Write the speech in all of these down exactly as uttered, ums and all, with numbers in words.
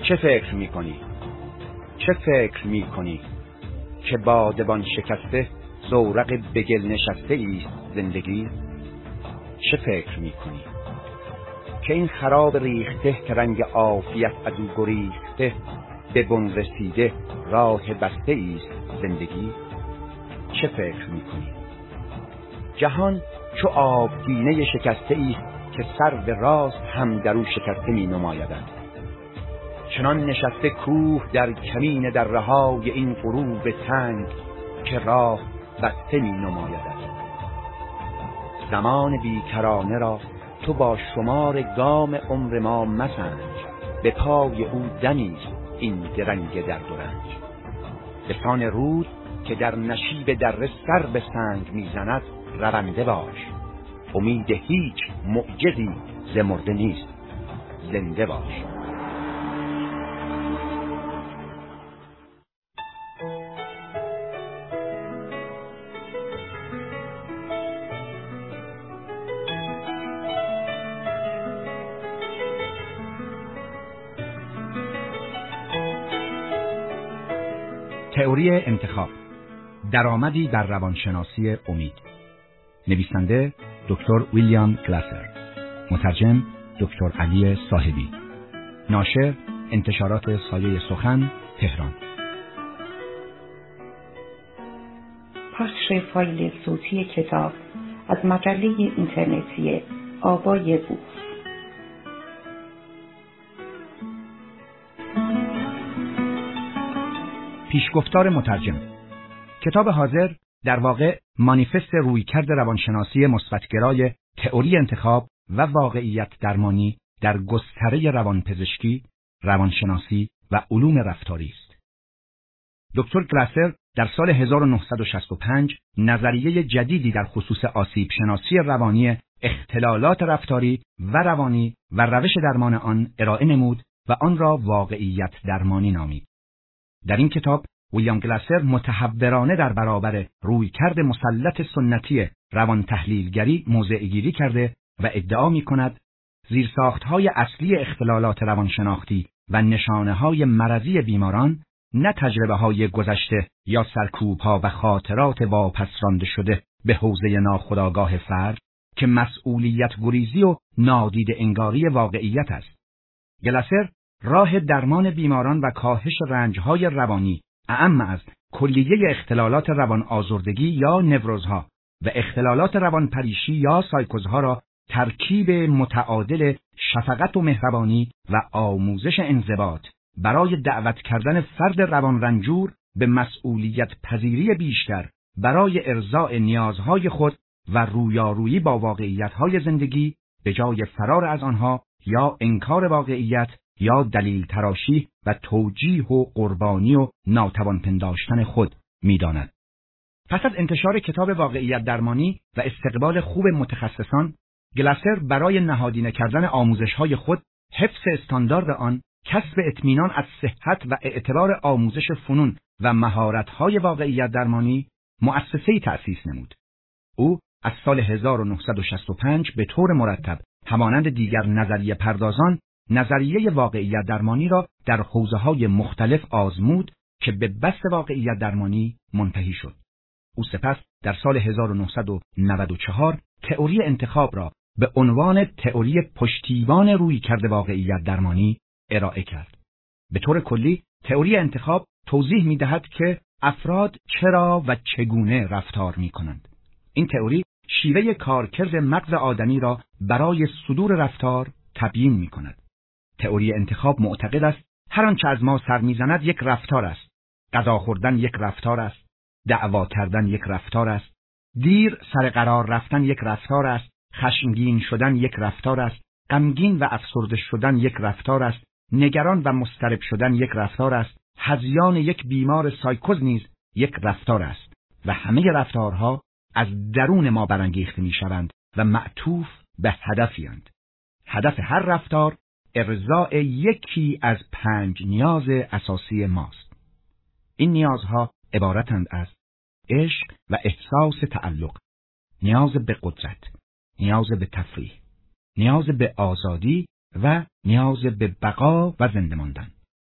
چه فکر میکنی؟ چه فکر میکنی که بادبان شکسته زورق بگل نشسته ایست زندگی؟ چه فکر میکنی که این خراب ریخته که رنگ عافیت از او گریخته به بن رسیده راه بسته ایست زندگی؟ چه فکر میکنی جهان چو آبگینه شکسته ایست که سر به راست هم در او شکسته می نمایدند؟ چنان نشسته کوه در کمین در رهای این غروب تنگ که راه بسته می نمایدند. زمان بیکرانه را تو با شمار گام عمر ما مسنج، به پای او دمیست این درنگ درد و رنج. لسان رود که در نشیب دره سر به سنگ میزند رونده باش، امید هیچ معجزی ز مرده نیست، زنده باش. تئوری انتخاب، درآمدی در روانشناسی امید. نویسنده دکتر ویلیام گلاسر، مترجم دکتر علی صاحبی، ناشر انتشارات سایه سخن، تهران. پخش فایل صوتی کتاب از مجله اینترنتی آوای بوف. پیشگفتار مترجم. کتاب حاضر در واقع مانیفست رویکرد روانشناسی مثبت‌گرای تئوری انتخاب و واقعیت درمانی در گستره روانپزشکی، روانشناسی و علوم رفتاری است. دکتر گلاسر در سال هزار و نهصد و شصت و پنج نظریه جدیدی در خصوص آسیب شناسی روانی اختلالات رفتاری و روانی و روش درمان آن ارائه نمود و آن را واقعیت درمانی نامید. در این کتاب ویلیام گلاسر متحورانه در برابر رویکرد مسلط سنتی روان تحلیلگری موضع‌گیری کرده و ادعا می‌کند زیرساخت‌های اصلی اختلالات روانشناختی و نشانه‌های مرضی بیماران نه تجربه‌های گذشته یا سرکوب‌ها و خاطرات واپس رانده شده به حوزه ناخودآگاه فرد که مسئولیت گریزی و نادیده انگاری واقعیت است. گلاسر راه درمان بیماران و کاهش رنج‌های روانی اعم از کلیه اختلالات روان آزردگی یا نوروزها و اختلالات روان پریشی یا سایکوزها را ترکیب متعادل شفقت و مهربانی و آموزش انضباط برای دعوت کردن فرد روان رنجور به مسئولیت پذیری بیشتر برای ارضاء نیازهای خود و رویارویی با واقعیت‌های زندگی به جای فرار از آنها یا انکار واقعیت یا دلیل تراشی و توجیه و قربانی و ناتوان پنداشتن خود می‌داند. پس از انتشار کتاب واقعیت درمانی و استقبال خوب متخصصان، گلاسر برای نهادینه کردن آموزش‌های خود، حفظ استاندارد آن، کسب اطمینان از صحت و اعتبار آموزش فنون و مهارت‌های واقعیت درمانی، مؤسسه‌ای تأسیس نمود. او از سال هزار و نهصد و شصت و پنج به طور مرتب همانند دیگر نظریه پردازان نظریه واقعیت درمانی را در حوزه‌های مختلف آزمود که به بست واقعیت درمانی منتهی شد. او سپس در سال هزار و نهصد و نود و چهار تئوری انتخاب را به عنوان تئوری پشتیبان رویکرد واقعیت درمانی ارائه کرد. به طور کلی تئوری انتخاب توضیح می‌دهد که افراد چرا و چگونه رفتار می‌کنند. این تئوری شیوه کارکرد مغز آدمی را برای صدور رفتار تبیین می‌کند. تئوری انتخاب معتقد است هر آنچه از ما سر می‌زند یک رفتار است. غذا خوردن یک رفتار است. دعوا کردن یک رفتار است. دیر سر قرار رفتن یک رفتار است. خشمگین شدن یک رفتار است. غمگین و افسرده شدن یک رفتار است. نگران و مضطرب شدن یک رفتار است. هذیان یک بیمار سایکوز نیز یک رفتار است. و همه رفتارها از درون ما برانگیخته می‌شوند و معطوف به هدفی‌اند. هدف هر رفتار ارضاء یکی از پنج نیاز اساسی ماست. این نیازها عبارتند از عشق و احساس تعلق، نیاز به قدرت، نیاز به تفریح، نیاز به آزادی و نیاز به بقا و زنده ماندن.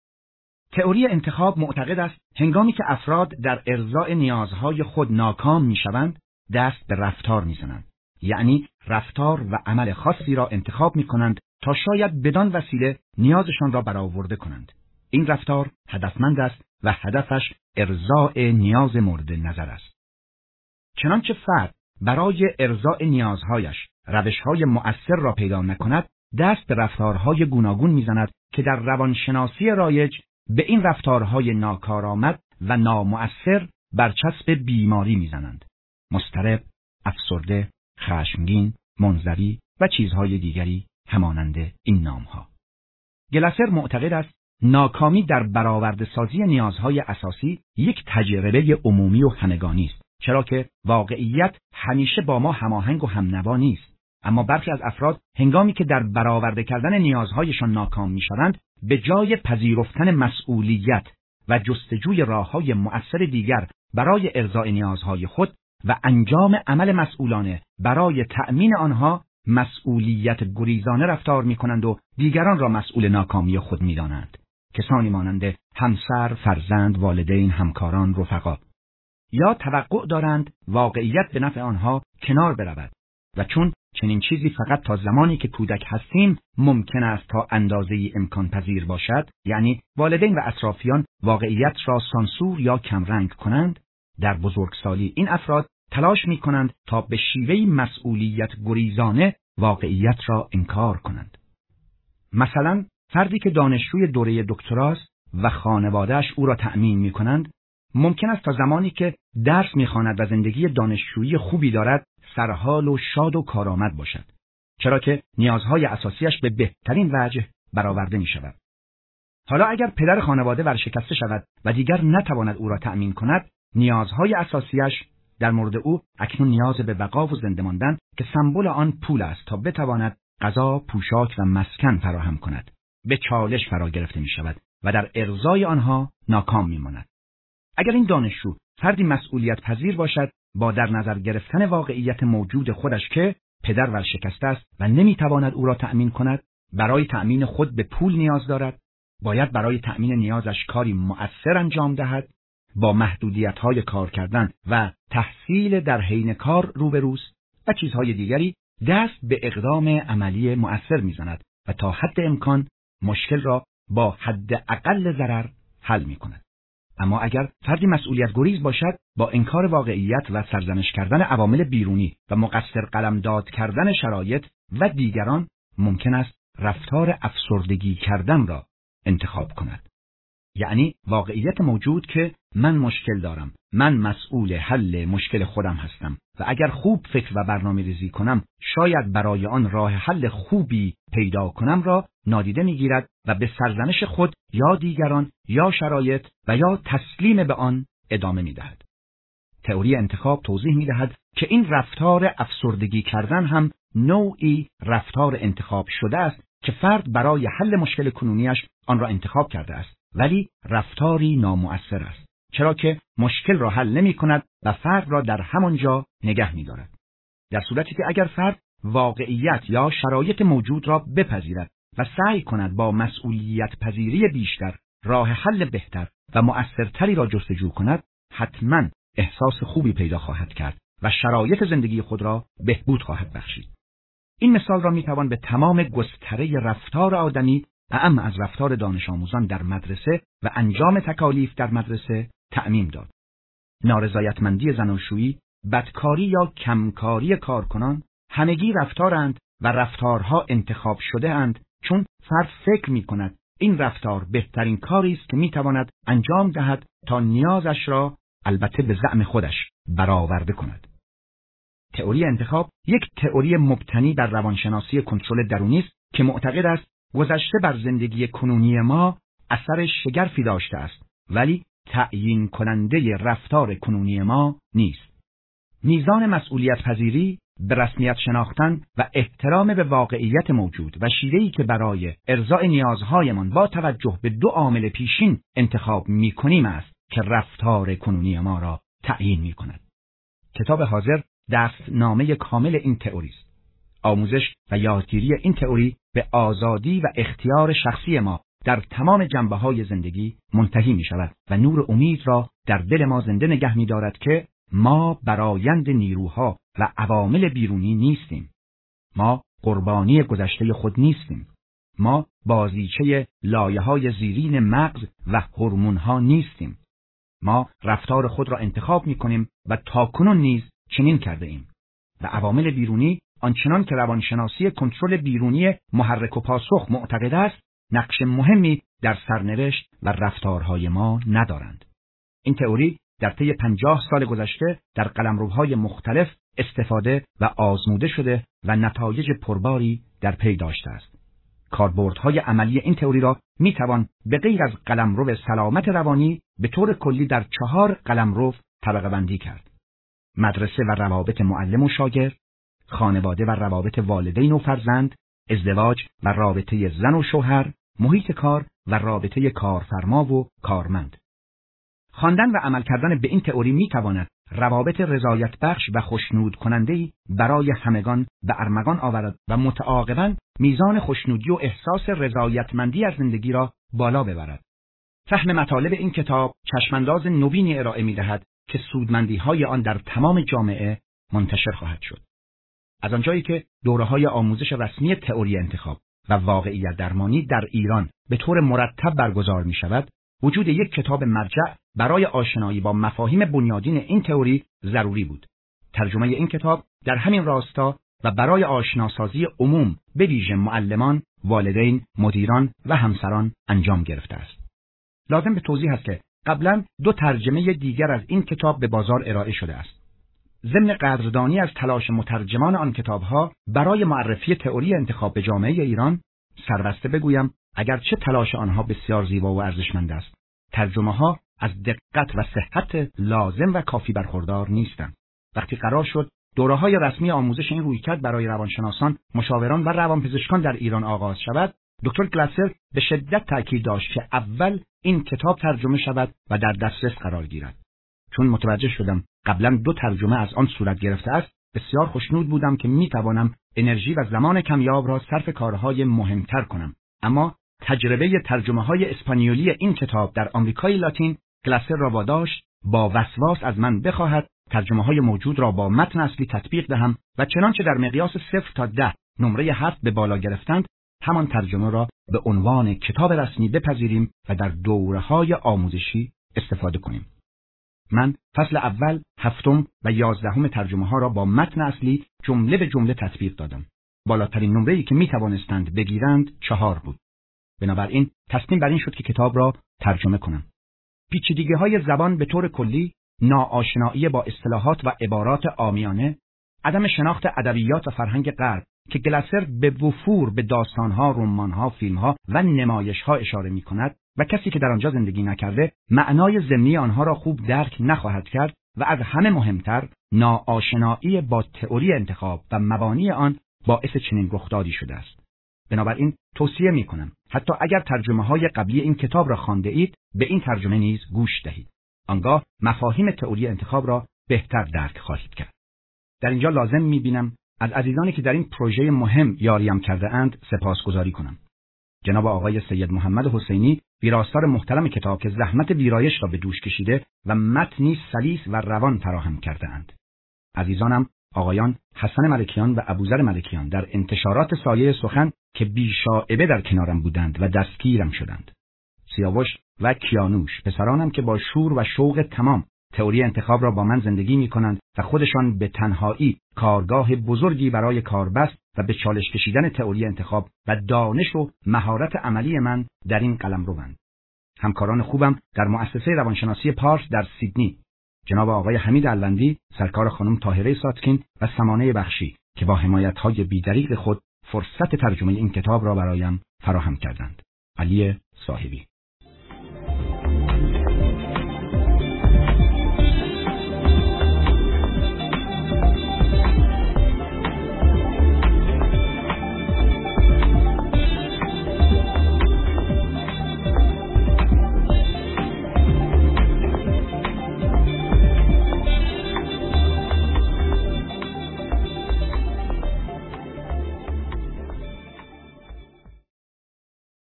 تئوری انتخاب معتقد است هنگامی که افراد در ارضاء نیازهای خود ناکام میشوند، دست به رفتار میزنند. یعنی رفتار و عمل خاصی را انتخاب میکنند تا شاید بدان وسیله نیازشان را برآورده کنند. این رفتار هدفمند است و هدفش ارضاء نیاز مورد نظر است. چنانچه فرد برای ارضاء نیازهایش روشهای مؤثر را پیدا نکند، دست به رفتارهای گوناگون میزند که در روانشناسی رایج به این رفتارهای ناکارآمد و نامؤثر برچسب بیماری میزنند. مضطرب، افسرده، خشمگین، منزوی و چیزهای دیگری همانند این نامها. گلاسر معتقد است ناکامی در برآورده سازی نیازهای اساسی یک تجربه عمومی و همگانی است، چرا که واقعیت همیشه با ما هماهنگ و همنوا نیست. اما برخی از افراد هنگامی که در برآورده کردن نیازهایشان ناکام میشوند، به جای پذیرفتن مسئولیت و جستجوی راههای مؤثر دیگر برای ارضاء نیازهای خود و انجام عمل مسئولانه برای تأمین آنها، مسئولیت گریزانه رفتار می‌کنند و دیگران را مسئول ناکامی خود می‌دانند. کسانی مانند همسر، فرزند، والدین، همکاران، رفقا. یا توقع دارند واقعیت به نفع آنها کنار برود و چون چنین چیزی فقط تا زمانی که کودک هستیم ممکن است تا اندازه‌ای امکان پذیر باشد، یعنی والدین و اطرافیان واقعیت را سانسور یا کمرنگ کنند، در بزرگسالی این افراد تلاش می کنند تا به شیوهی مسئولیت گریزانه واقعیت را انکار کنند. مثلا فردی که دانشجوی دوره دکتراست و خانواده‌اش او را تأمین می کنند، ممکن است تا زمانی که درس می خواند و زندگی دانشجویی خوبی دارد سرحال و شاد و کارآمد باشد، چرا که نیازهای اساسیش به بهترین وجه برآورده می شود. حالا اگر پدر خانواده ورشکسته شود و دیگر نتواند او را تأمین کند، نیازهای اساسیش در مورد او اکنون نیاز به بقا و زنده ماندن که سمبل آن پول است تا بتواند غذا، پوشاک و مسکن فراهم کند، به چالش فرا گرفته می شود و در ارضای آنها ناکام می ماند. اگر این دانشجو فردی مسئولیت پذیر باشد، با در نظر گرفتن واقعیت موجود خودش که پدر ورشکسته است و نمی تواند او را تأمین کند، برای تأمین خود به پول نیاز دارد، باید برای تأمین نیازش کاری مؤثر انجام دهد، با محدودیت‌های کار کردن و تحصیل در حین کار روبروست و چیزهای دیگری، دست به اقدام عملی مؤثر می‌زند و تا حد امکان مشکل را با حد اقل ضرر حل می‌کند. اما اگر فردی مسئولیت گریز باشد، با انکار واقعیت و سرزنش کردن عوامل بیرونی و مقصر قلمداد کردن شرایط و دیگران، ممکن است رفتار افسردگی کردن را انتخاب کند. یعنی واقعیت موجود که من مشکل دارم، من مسئول حل مشکل خودم هستم و اگر خوب فکر و برنامه ریزی کنم شاید برای آن راه حل خوبی پیدا کنم را نادیده میگیرد و به سرزنش خود یا دیگران یا شرایط و یا تسلیم به آن ادامه میدهد. تئوری انتخاب توضیح میدهد که این رفتار افسردگی کردن هم نوعی رفتار انتخاب شده است که فرد برای حل مشکل کنونیش آن را انتخاب کرده است، ولی رفتاری نامؤثر است، چرا که مشکل را حل نمی کند و فرد را در همانجا نگه می دارد. در صورتی که اگر فرد واقعیت یا شرایط موجود را بپذیرد و سعی کند با مسئولیت پذیری بیشتر راه حل بهتر و مؤثرتری را جستجو کند، حتما احساس خوبی پیدا خواهد کرد و شرایط زندگی خود را بهبود خواهد بخشید. این مثال را می توان به تمام گستره رفتار آدمی، اعم از رفتار دانش آموزان در مدرسه و انجام تکالیف در مدرسه تعمیم داد. نارضایتمندی زناشویی، بدکاری یا کمکاری کارکنان همگی رفتارند و رفتارها انتخاب شده اند، چون فرد فکر می کند این رفتار بهترین کاری است که می تواند انجام دهد تا نیازش را البته به زعم خودش برآورده کند. تئوری انتخاب یک تئوری مبتنی بر روانشناسی کنترل درونی است که معتقد است گذشته بر زندگی کنونی ما اثر شگرفی داشته است، ولی تعیین کننده رفتار کنونی ما نیست. میزان مسئولیت پذیری، به رسمیت شناختن و احترام به واقعیت موجود و شیوهی که برای ارضاء نیازهایمان با توجه به دو عامل پیشین انتخاب می‌کنیم است که رفتار کنونی ما را تعیین می‌کند. کتاب حاضر دستنامه کامل این تئوری است. آموزش و یادگیری این تئوری به آزادی و اختیار شخصی ما در تمام جنبه‌های زندگی منتهی می‌شود و نور امید را در دل ما زنده نگه می‌دارد که ما برآیند نیروها و عوامل بیرونی نیستیم. ما قربانی گذشته خود نیستیم. ما بازیچه لایه‌های زیرین مغز و هورمون‌ها نیستیم. ما رفتار خود را انتخاب می‌کنیم و تاکنون نیز چنین کرده ایم. و عوامل بیرونی آنچنان که روانشناسی کنترل بیرونی محرک و پاسخ معتقد است، نقش مهمی در سرنوشت و رفتارهای ما ندارند. این تئوری در طی پنجاه سال گذشته در قلمروهای مختلف استفاده و آزموده شده و نتایج پرباری در پی داشته است. کاربردهای عملی این تئوری را می توان به غیر از قلمرو سلامت روانی به طور کلی در چهار قلمرو طبقه بندی کرد: مدرسه و روابط معلم و شاگرد، خانواده و روابط والدین و فرزند، ازدواج و رابطه زن و شوهر، محیط کار و رابطه کارفرما و کارمند. خواندن و عمل کردن به این تئوری می تواند روابط رضایت بخش و خوشنود کننده‌ای برای همگان به ارمغان آورد و متعاقباً میزان خوشنودی و احساس رضایتمندی از زندگی را بالا ببرد. فهم مطالب این کتاب چشمانداز نوینی ارائه می‌دهد که سودمندی‌های آن در تمام جامعه منتشر خواهد شد. از آنجایی که دوره‌های آموزش رسمی تئوری انتخاب و واقعیت درمانی در ایران به طور مرتب برگزار می‌شود، وجود یک کتاب مرجع برای آشنایی با مفاهیم بنیادین این تئوری ضروری بود. ترجمه این کتاب در همین راستا و برای آشناسازی عموم به ویژه معلمان، والدین، مدیران و همسران انجام گرفته است. لازم به توضیح است که قبلا دو ترجمه دیگر از این کتاب به بازار ارائه شده است. ضمن قدردانی از تلاش مترجمان آن کتاب‌ها برای معرفی تئوری انتخاب به جامعه ایران، سربسته بگویم اگرچه تلاش آنها بسیار زیبا و ارزشمند است، ترجمه‌ها از دقت و صحت لازم و کافی برخوردار نیستند. وقتی قرار شد دوره‌های رسمی آموزش این رویکرد برای روانشناسان، مشاوران و روانپزشکان در ایران آغاز شود، دکتر گلاسر به شدت تاکید داشت که اول این کتاب ترجمه شود و در دسترس قرار گیرد. چون متوجه شدم قبلا دو ترجمه از آن صورت گرفته است، بسیار خوشنود بودم که میتوانم انرژی و زمان کمیاب را صرف کارهای مهمتر کنم. اما تجربه ترجمه‌های اسپانیولی این کتاب در آمریکای لاتین گلاسر را واداشت با وسواس از من بخواهد ترجمه‌های موجود را با متن اصلی تطبیق دهم و چنانچه در مقیاس صفر تا ده نمره هفت به بالا گرفتند، همان ترجمه را به عنوان کتاب رسمی بپذیریم و در دوره‌های آموزشی استفاده کنیم. من فصل اول، هفتم و یازدهم ترجمه‌ها را با متن اصلی جمله به جمله تطبیق دادم. بالاترین نمره‌ای که می‌توانستند بگیرند چهار بود. بنابراین تصمیم بر این شد که کتاب را ترجمه کنم. پیچیدگی‌های زبان به طور کلی، ناآشنایی با اصطلاحات و عبارات عامیانه، عدم شناخت ادبیات و فرهنگ غرب که گلاسر به وفور به داستان‌ها، رمان‌ها، فیلم‌ها و نمایش‌ها اشاره می‌کند و کسی که در آنجا زندگی نکرده معنای ضمنی آنها را خوب درک نخواهد کرد و از همه مهمتر ناآشنایی با تئوری انتخاب و مبانی آن باعث چنین رخدادی شده است. بنابراین توصیه می‌کنم حتی اگر ترجمه‌های قبلی این کتاب را خوانده اید، به این ترجمه نیز گوش دهید. آنگاه مفاهیم تئوری انتخاب را بهتر درک خواهید کرد. در اینجا لازم می‌بینم از عزیزانی که در این پروژه مهم یاریم کرده اند سپاسگزاری کنم. جناب آقای سید محمد حسینی، ویراستار محترم کتاب که زحمت ویرایش را به دوش کشیده و متنی سلیس و روان فراهم کرده اند. عزیزانم آقایان حسن ملکیان و ابوذر ملکیان در انتشارات سایه سخن که بی‌شائبه در کنارم بودند و دستگیرم شدند. سیاوش و کیانوش، پسرانم که با شور و شوق تمام تئوری انتخاب را با من زندگی می کنند و خودشان به تنهایی کارگاه بزرگی برای کاربست و به چالش کشیدن تئوری انتخاب و دانش و مهارت عملی من در این قلمروند. همکاران خوبم در مؤسسه روانشناسی پارس در سیدنی، جناب آقای حمید الوندی، سرکار خانم طاهره ساتکین و سمانه بخشی که با حمایت‌های بی‌دریغ خود فرصت ترجمه این کتاب را برایم فراهم کردند. علی صاحبی.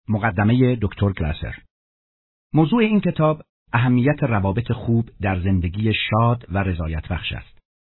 مقدمه دکتر گلاسر. موضوع این کتاب اهمیت روابط خوب در زندگی شاد و رضایت بخش است.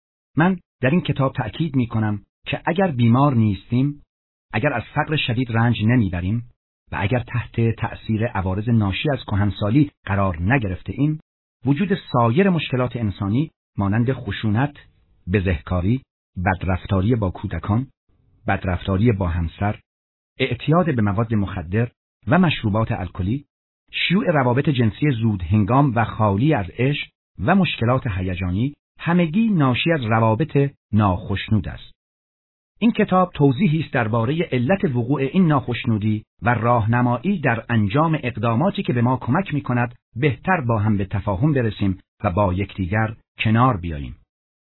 من در این کتاب تأکید می کنم که اگر بیمار نیستیم، اگر از فقر شدید رنج نمیبریم و اگر تحت تأثیر عوارض ناشی از کهنسالی قرار نگرفته ایم، وجود سایر مشکلات انسانی مانند خشونت، بزهکاری، بدرفتاری با کودکان، بدرفتاری با همسر، اعتیاد به مواد مخدر و مشروبات الکلی، شیوع روابط جنسی زود هنگام و خالی از عشق و مشکلات هیجانی، همگی ناشی از روابط ناخشنود است. این کتاب توضیحی است درباره علت وقوع این ناخشنودی و راهنمایی در انجام اقداماتی که به ما کمک می‌کند بهتر با هم به تفاهم برسیم و با یکدیگر کنار بیاییم.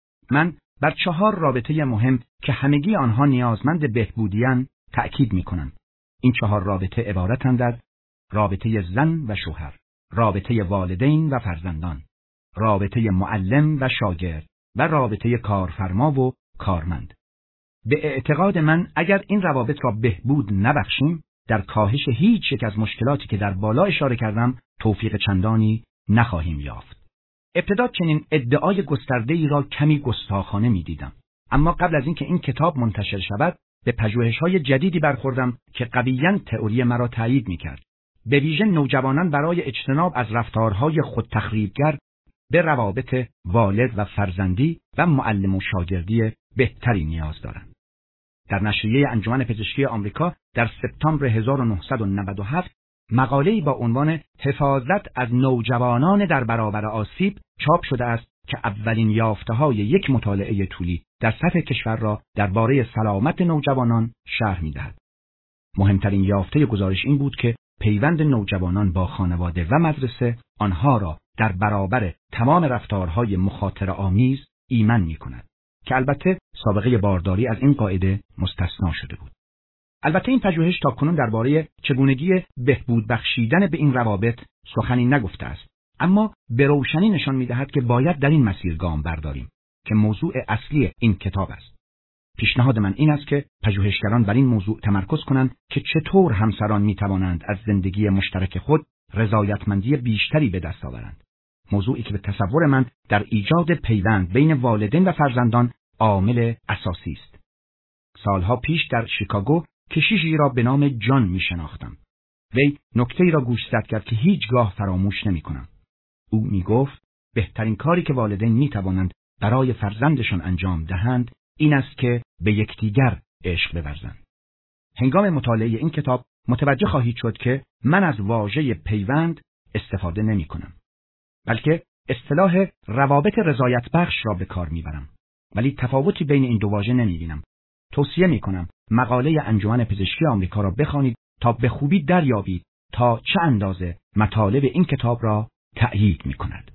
من بر چهار رابطه مهم که همگی آنها نیازمند بهبودی‌اند تأکید می‌کنم. این چهار رابطه عبارتند از رابطه زن و شوهر، رابطه والدین و فرزندان، رابطه معلم و شاگرد و رابطه کارفرما و کارمند. به اعتقاد من اگر این روابط را بهبود نبخشیم، در کاهش هیچ یک از مشکلاتی که در بالا اشاره کردم توفیق چندانی نخواهیم یافت. ابتدا چنین ادعای گسترده‌ای را کمی گستاخانه می‌دیدم، اما قبل از اینکه این کتاب منتشر شود، به پژوهش‌های جدیدی برخوردم که قویاً تئوری مرا تایید می‌کرد. به ویژه نوجوانان برای اجتناب از رفتارهای خودتخریبگر به روابط والد و فرزندی و معلم و شاگردی بهتری نیاز دارند. در نشریه انجمن پزشکی آمریکا در سپتامبر هزار و نهصد و نود و هفت مقاله‌ای با عنوان حفاظت از نوجوانان در برابر آسیب چاپ شده است که اولین یافته‌های یک مطالعه طولی در سطح کشور را درباره سلامت نوجوانان شرح می‌دهد. مهمترین یافته گزارش این بود که پیوند نوجوانان با خانواده و مدرسه آنها را در برابر تمام رفتارهای مخاطره‌آمیز ایمن می‌کند که البته سابقه بارداری از این قاعده مستثنا شده بود. البته این پژوهش تاکنون درباره چگونگی بهبود بخشیدن به این روابط سخنی نگفته است، اما به روشنی نشان می‌دهد که باید در این مسیر گام برداریم که موضوع اصلی این کتاب است. پیشنهاد من این است که پژوهشگران بر این موضوع تمرکز کنند که چطور همسران می‌توانند از زندگی مشترک خود رضایتمندی بیشتری به دست آورند. موضوعی که به تصور من در ایجاد پیوند بین والدین و فرزندان عامل اساسی است. سالها پیش در شیکاگو کشیشی را به نام جان می‌شناختم. وی نکته‌ای را گوشزد کرد که هیچگاه فراموش نمی‌کنم. او می‌گفت بهترین کاری که والدین می‌توانند برای فرزندشان انجام دهند این است که به یکدیگر عشق بورزند. هنگام مطالعه این کتاب متوجه خواهید شد که من از واژه پیوند استفاده نمی‌کنم، بلکه اصطلاح روابط رضایت بخش را به کار می‌برم، ولی تفاوتی بین این دو واژه نمی‌بینم. توصیه می‌کنم مقاله انجمن پزشکی آمریکا را بخوانید تا به خوبی دریابید تا چه اندازه مطالب این کتاب را تأیید می‌کند.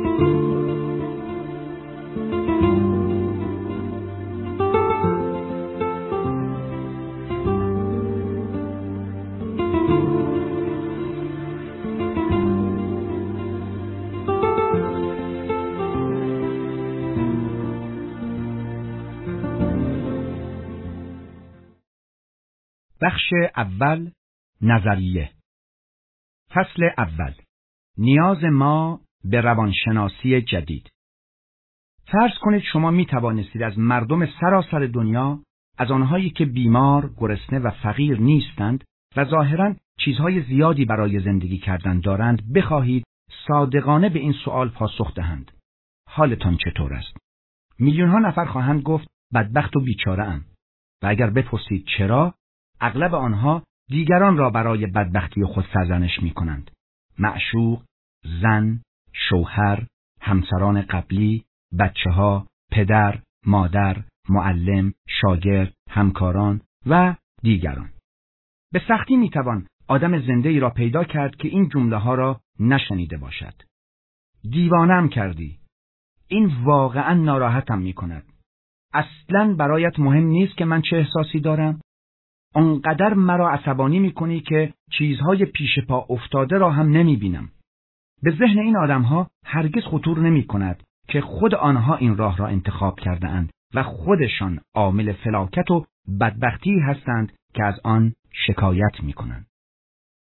بخش اول، نظریه. فصل اول، نیاز ما به روانشناسی جدید. فرض کنید شما می توانستید از مردم سراسر دنیا، از آنهایی که بیمار، گرسنه و فقیر نیستند و ظاهراً چیزهای زیادی برای زندگی کردن دارند، بخواهید صادقانه به این سوال پاسخ دهند: حالتان چطور است؟ میلیون‌ها نفر خواهند گفت بدبخت و بیچاره ام. و اگر بپرسید چرا، اغلب آنها دیگران را برای بدبختی خود سرزنش می کنند. معشوق، زن، شوهر، همسران قبلی، بچه ها، پدر، مادر، معلم، شاگرد، همکاران و دیگران. به سختی می توان آدم زنده ای را پیدا کرد که این جمله ها را نشنیده باشد. دیوانم کردی. این واقعا ناراحتم می کند. اصلاً برایت مهم نیست که من چه احساسی دارم؟ آنقدر مرا عصبانی می‌کنی که چیزهای پیش پا افتاده را هم نمی‌بینم. به ذهن این آدم‌ها هرگز خطور نمی‌کند که خود آنها این راه را انتخاب کرده‌اند و خودشان عامل فلاکت و بدبختی هستند که از آن شکایت می‌کنند.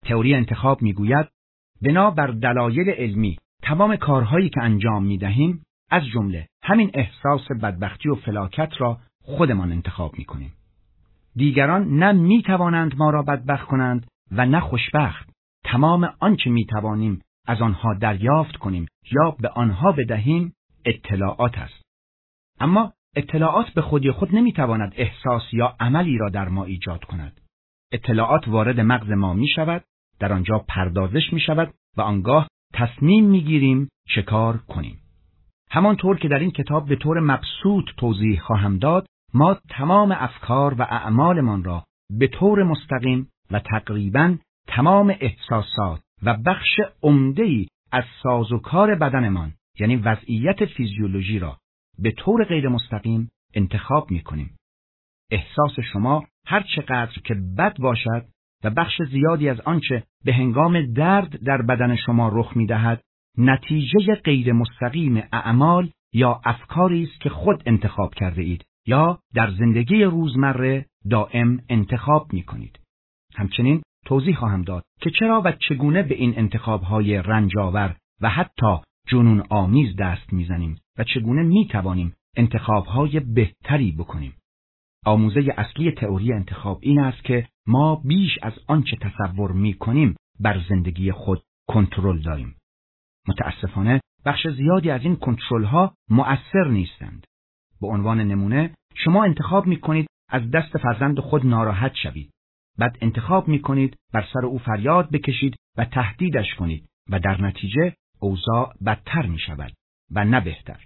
تئوری انتخاب میگوید بنا بر دلایل علمی تمام کارهایی که انجام میدهیم از جمله همین احساس بدبختی و فلاکت را خودمان انتخاب میکنیم. دیگران نه میتوانند ما را بدبخت کنند و نه خوشبخت. تمام آنچه میتوانیم از آنها دریافت کنیم یا به آنها بدهیم اطلاعات است. اما اطلاعات به خودی خود نمیتواند احساس یا عملی را در ما ایجاد کند. اطلاعات وارد مغز ما می شود، در آنجا پردازش می شود و آنگاه تصمیم می گیریم چه کار کنیم. همانطور که در این کتاب به طور مبسوط توضیح خواهم داد، ما تمام افکار و اعمالمان را به طور مستقیم و تقریباً تمام احساسات و بخش عمده‌ای از سازوکار بدنمان یعنی وضعیت فیزیولوژی را به طور غیر مستقیم انتخاب می کنیم. احساس شما هر چقدر که بد باشد و بخش زیادی از آنچه به هنگام درد در بدن شما رخ می دهد، نتیجه غیر مستقیم اعمال یا افکاری است که خود انتخاب کرده اید یا در زندگی روزمره دائم انتخاب می کنید. همچنین توضیح خواهم داد که چرا و چگونه به این انتخاب‌های رنجاور و حتی جنون آمیز دست می‌زنیم و چگونه می‌توانیم انتخاب‌های بهتری بکنیم. آموزه اصلی تئوری انتخاب این است که ما بیش از آنچه تصور می‌کنیم بر زندگی خود کنترل داریم. متأسفانه بخش زیادی از این کنترل‌ها مؤثر نیستند. به عنوان نمونه شما انتخاب می‌کنید از دست فرزند خود ناراحت شوید. بعد انتخاب می‌کنید بر سر او فریاد بکشید و تهدیدش کنید و در نتیجه اوضاع بدتر می‌شود و نه بهتر.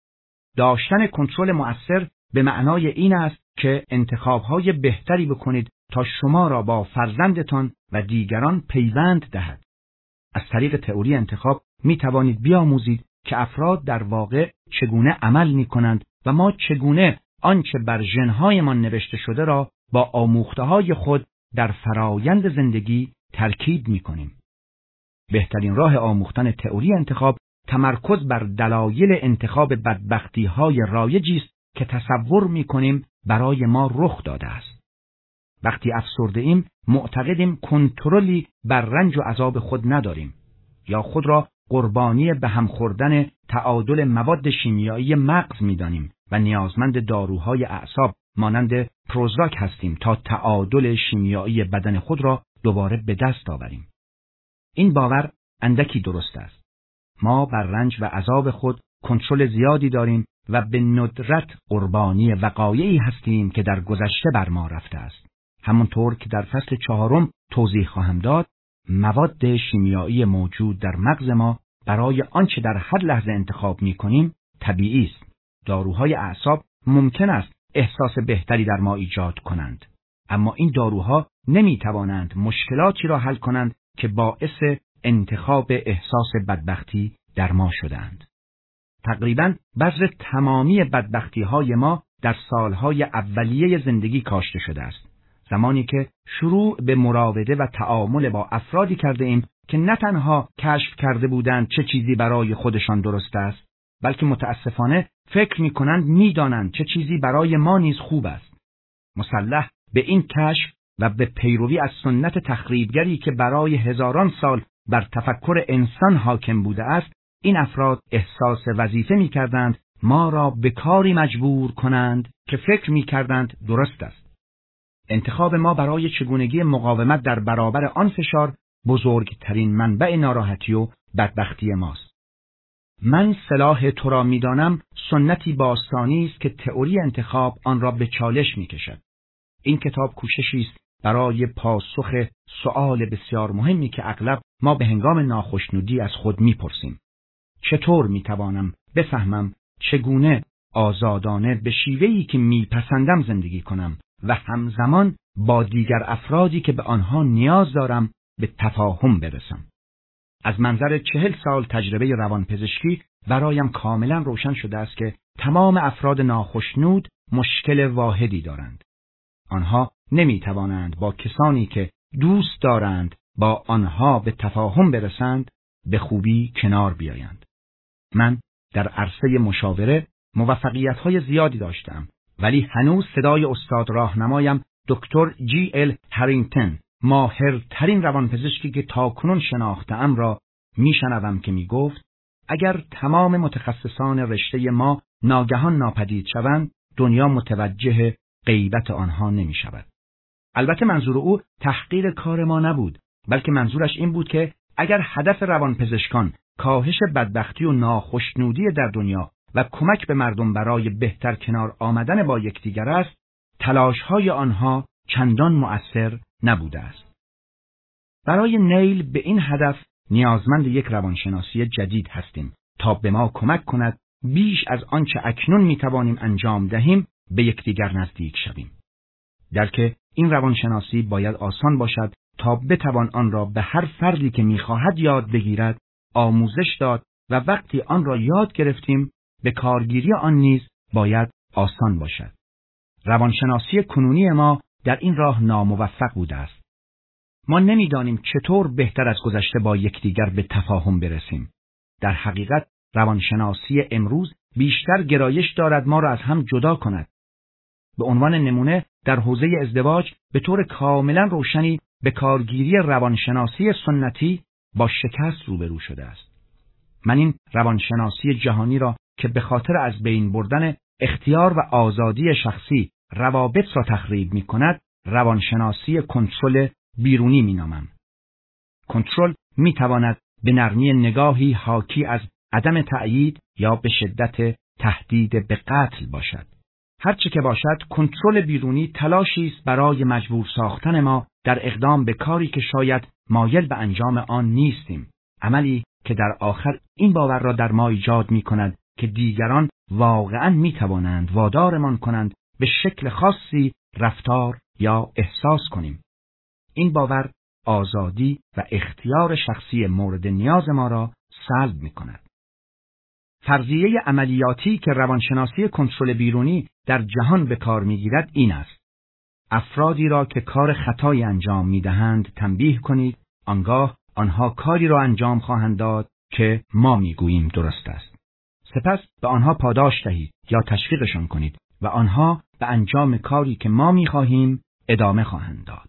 داشتن کنترل مؤثر به معنای این است که انتخاب‌های بهتری بکنید تا شما را با فرزندتان و دیگران پیوند دهد. از طریق تئوری انتخاب می‌توانید بیاموزید که افراد در واقع چگونه عمل می‌کنند و ما چگونه آنچه بر ژن‌هایمان نوشته شده را با آموخته‌های خود در فرایند زندگی ترکیب می‌کنیم. بهترین راه آموختن تئوری انتخاب تمرکز بر دلایل انتخاب بدبختی‌های رایجی است که تصور می‌کنیم برای ما رخ داده است. وقتی افسرده ایم معتقدیم کنترلی بر رنج و عذاب خود نداریم یا خود را قربانی به هم خوردن تعادل مواد شیمیایی مغز می‌دانیم و نیازمند داروهای اعصاب مانند پروزاک هستیم تا تعادل شیمیایی بدن خود را دوباره به دست آوریم. این باور اندکی درست است. ما بر رنج و عذاب خود کنترل زیادی داریم و به ندرت قربانی وقایعی هستیم که در گذشته بر ما رفته است. همونطور که در فصل چهارم توضیح خواهم داد، مواد شیمیایی موجود در مغز ما برای آنچه در هر لحظه انتخاب می کنیم طبیعی است. داروهای اعصاب ممکن است احساس بهتری در ما ایجاد کنند، اما این داروها نمی توانند مشکلاتی را حل کنند که باعث انتخاب احساس بدبختی در ما شدند. تقریباً بذر تمامی بدبختی های ما در سالهای اولیه زندگی کاشته شده است. زمانی که شروع به مراوده و تعامل با افرادی کرده ایم که نه تنها کشف کرده بودند چه چیزی برای خودشان درست است، بلکه متاسفانه فکر می کنند می دانند چه چیزی برای ما نیز خوب است. مسلح به این کشف و به پیروی از سنت تخریبگری که برای هزاران سال بر تفکر انسان حاکم بوده است، این افراد احساس وظیفه می کردند ما را به کاری مجبور کنند که فکر می کردند درست است. انتخاب ما برای چگونگی مقاومت در برابر آن فشار بزرگترین منبع ناراحتی و بدبختی ماست. من صلاح تو را می دانم سنتی باستانی است که تئوری انتخاب آن را به چالش می کشد. این کتاب کوششی است برای پاسخ سؤال بسیار مهمی که اغلب ما به هنگام ناخشنودی از خود می پرسیم. چطور می توانم بفهمم چگونه آزادانه به شیوهی که می پسندم زندگی کنم و همزمان با دیگر افرادی که به آنها نیاز دارم به تفاهم برسم؟ از منظر چهل سال تجربه روانپزشکی برایم کاملا روشن شده است که تمام افراد ناخشنود مشکل واحدی دارند. آنها نمی توانند با کسانی که دوست دارند با آنها به تفاهم برسند به خوبی کنار بیایند. من در عرصه مشاوره موفقیت‌های زیادی داشتم، ولی هنوز صدای استاد راهنمایم دکتر جی ال هرینگتون ماهرترین روانپزشکی که تاکنون شناخته‌ام را میشنوم که میگفت اگر تمام متخصصان رشته ما ناگهان ناپدید شوند، دنیا متوجه غیبت آنها نمی شود. البته منظور او تحقیر کار ما نبود، بلکه منظورش این بود که اگر هدف روانپزشکان کاهش بدبختی و ناخشنودی در دنیا و کمک به مردم برای بهتر کنار آمدن با یکدیگر است، تلاش‌های آنها چندان مؤثر نبوده است. برای نیل به این هدف نیازمند یک روانشناسی جدید هستیم تا به ما کمک کند بیش از آنچه اکنون میتوانیم انجام دهیم به یکدیگر نزدیک شویم. درک این روانشناسی باید آسان باشد تا بتوان آن را به هر فردی که میخواهد یاد بگیرد آموزش داد و وقتی آن را یاد گرفتیم به کارگیری آن نیز باید آسان باشد. روانشناسی کنونی ما در این راه ناموفق بوده است. ما نمیدانیم چطور بهتر از گذشته با یکدیگر به تفاهم برسیم. در حقیقت روانشناسی امروز بیشتر گرایش دارد ما را از هم جدا کند. به عنوان نمونه در حوزه ازدواج به طور کاملا روشنی به کارگیری روانشناسی سنتی با شکست روبرو شده است. من این روانشناسی جهانی را که به خاطر از بین بردن اختیار و آزادی شخصی روابط را تخریب می کند، روانشناسی کنترل بیرونی می نامم. کنترل می تواند به نرمی نگاهی حاکی از عدم تأیید یا به شدت تهدید به قتل باشد. هرچه که باشد، کنترل بیرونی تلاشی است برای مجبور ساختن ما در اقدام به کاری که شاید مایل به انجام آن نیستیم. عملی که در آخر این باور را در ما ایجاد می کند که دیگران واقعاً می توانند وادارمان کنند به شکل خاصی رفتار یا احساس کنیم. این باور آزادی و اختیار شخصی مورد نیاز ما را سلب می کند. فرضیه عملیاتی که روانشناسی کنترل بیرونی در جهان به کار می گیرد این است: افرادی را که کار خطایی انجام می دهند تنبیه کنید، آنگاه آنها کاری را انجام خواهند داد که ما می گوییم درست است. سپس به آنها پاداش دهید یا تشویقشان کنید و آنها به انجام کاری که ما می خواهیم ادامه خواهند داد.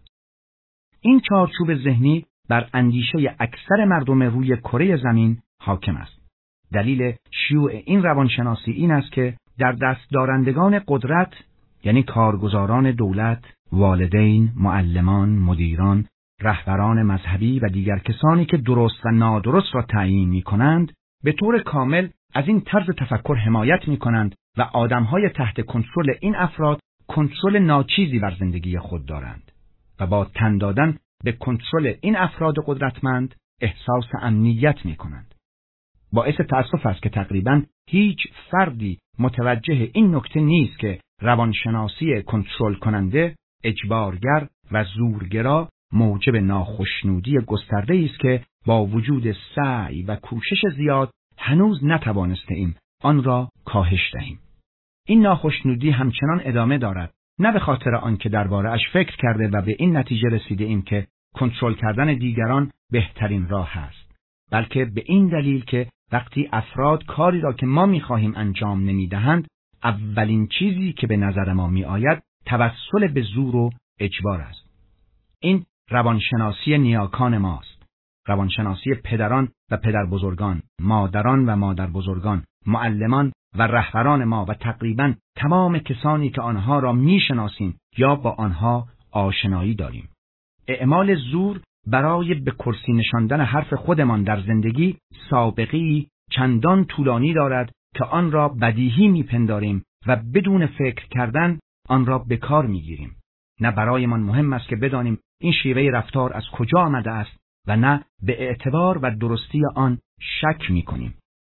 این چارچوب ذهنی بر اندیشه اکثر مردم روی کره زمین حاکم است. دلیل شیوع این روانشناسی این است که در دست دارندگان قدرت، یعنی کارگزاران دولت، والدین، معلمان، مدیران، رهبران مذهبی و دیگر کسانی که درست و نادرست را تعیین می کنند، به طور کامل از این طرز تفکر حمایت می کنند و آدمهای تحت کنترل این افراد کنترل ناچیزی بر زندگی خود دارند و با تن دادن به کنترل این افراد قدرتمند احساس امنیت می کنند. باعث تأسف است که تقریباً هیچ فردی متوجه این نکته نیست که روانشناسی کنترل کننده، اجبارگر و زورگرا موجب ناخشنودی گسترده است که با وجود سعی و کوشش زیاد هنوز نتوانسته ایم آن را کاهش دهیم. این ناخشنودی همچنان ادامه دارد، نه به خاطر آنکه درباره اش فکر کرده و به این نتیجه رسیده ایم که کنترل کردن دیگران بهترین راه است، بلکه به این دلیل که وقتی افراد کاری را که ما می‌خواهیم انجام نمی‌دهند، اولین چیزی که به نظر ما می‌آید توسل به زور و اجبار است. این روانشناسی نیاکان ماست. روانشناسی پدران و پدربزرگان، مادران و مادربزرگان، معلمان و رهبران ما و تقریباً تمام کسانی که آنها را می‌شناسیم یا با آنها آشنایی داریم. اعمال زور برای به کرسی نشاندن حرف خودمان در زندگی سابقه‌ای چندان طولانی دارد که آن را بدیهی میپنداریم و بدون فکر کردن آن را به کار میگیریم. نه برایمان مهم است که بدانیم این شیوه رفتار از کجا آمده است و نه به اعتبار و درستی آن شک میکنیم.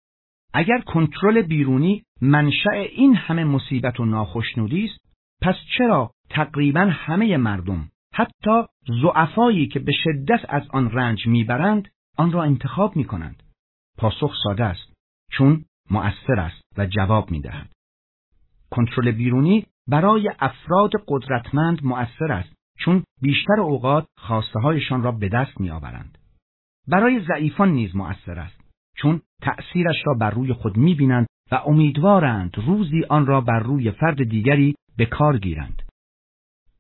اگر کنترل بیرونی منشأ این همه مصیبت و ناخشنودی است، پس چرا تقریباً همه مردم، حتی ضعفایی که به شدت از آن رنج میبرند، آن را انتخاب میکنند؟ پاسخ ساده است: چون مؤثر است و جواب میدهد. کنترل بیرونی برای افراد قدرتمند مؤثر است، چون بیشتر اوقات خواسته هایشان را به دست میآورند. برای ضعیفان نیز مؤثر است، چون تأثیرش را بر روی خود میبینند و امیدوارند روزی آن را بر روی فرد دیگری به کار گیرند.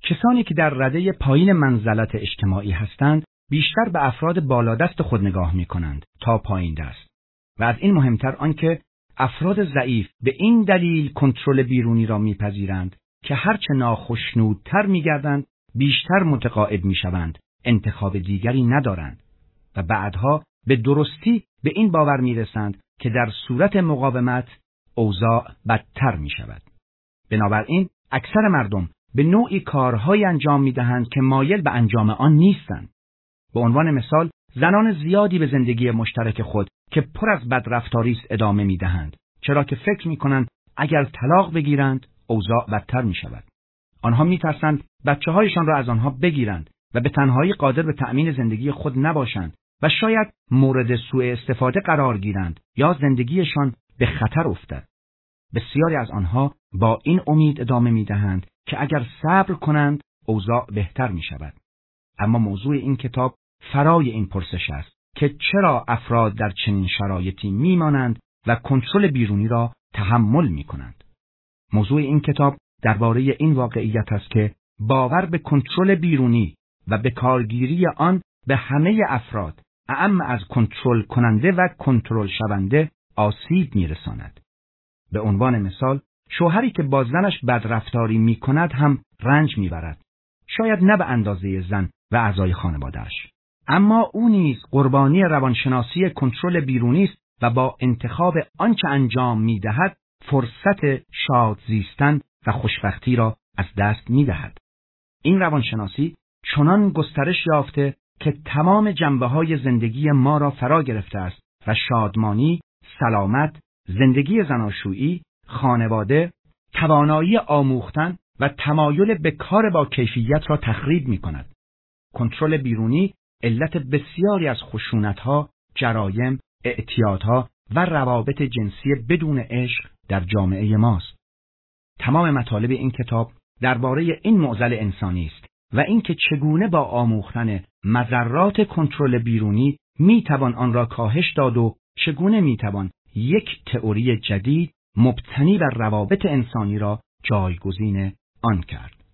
کسانی که در رده پایین منزلت اجتماعی هستند بیشتر به افراد بالادست خود نگاه می کنند تا پایین دست و از این مهمتر آنکه افراد ضعیف به این دلیل کنترل بیرونی را میپذیرند که هرچه ناخشنودتر میگردند بیشتر متقاعد میشوند انتخاب دیگری ندارند و بعدها به درستی به این باور میرسند که در صورت مقاومت اوضاع بدتر میشود. بنابراین اکثر مردم به نوعی کارهای انجام میدهند که مایل به انجام آن نیستند. به عنوان مثال زنان زیادی به زندگی مشترک خود که پر از بدرفتاری است ادامه میدهند، چرا که فکر میکنند اگر طلاق بگیرند اوضاع بدتر میشود. آنها میترسند بچه‌هایشان را از آنها بگیرند و به تنهایی قادر به تأمین زندگی خود نباشند و شاید مورد سوء استفاده قرار گیرند یا زندگیشان به خطر افتد. بسیاری از آنها با این امید ادامه میدهند که اگر صبر کنند اوضاع بهتر میشود. اما موضوع این کتاب فرای این پرسش است که چرا افراد در چنین شرایطی میمانند و کنترل بیرونی را تحمل میکنند. موضوع این کتاب درباره این واقعیت است که باور به کنترل بیرونی و به کارگیری آن به همه افراد، اعم از کنترل کننده و کنترل شونده، آسیب میرساند. به عنوان مثال، شوهری که با زنش بدرفتاری میکند هم رنج میبرد. شاید نه به اندازه زن و اعضای خانواده‌اش، اما او نیز قربانی روانشناسی کنترل بیرونی است و با انتخاب آنچه انجام میدهد فرصت شاد زیستن و خوشبختی را از دست میدهد. این روانشناسی چنان گسترش یافته که تمام جنبه‌های زندگی ما را فرا گرفته است و شادمانی، سلامت، زندگی زناشویی، خانواده، توانایی آموختن و تمایل به کار با کیفیت را تخریب می‌کند. کنترل بیرونی علت بسیاری از خشونت‌ها، جرایم، اعتیادها و روابط جنسی بدون عشق در جامعه ماست. تمام مطالب این کتاب درباره این معضل انسانی است و اینکه چگونه با آموختن مضرات کنترل بیرونی میتوان آن را کاهش داد و چگونه میتوان یک تئوری جدید مبتنی بر روابط انسانی را جایگزین آن کرد.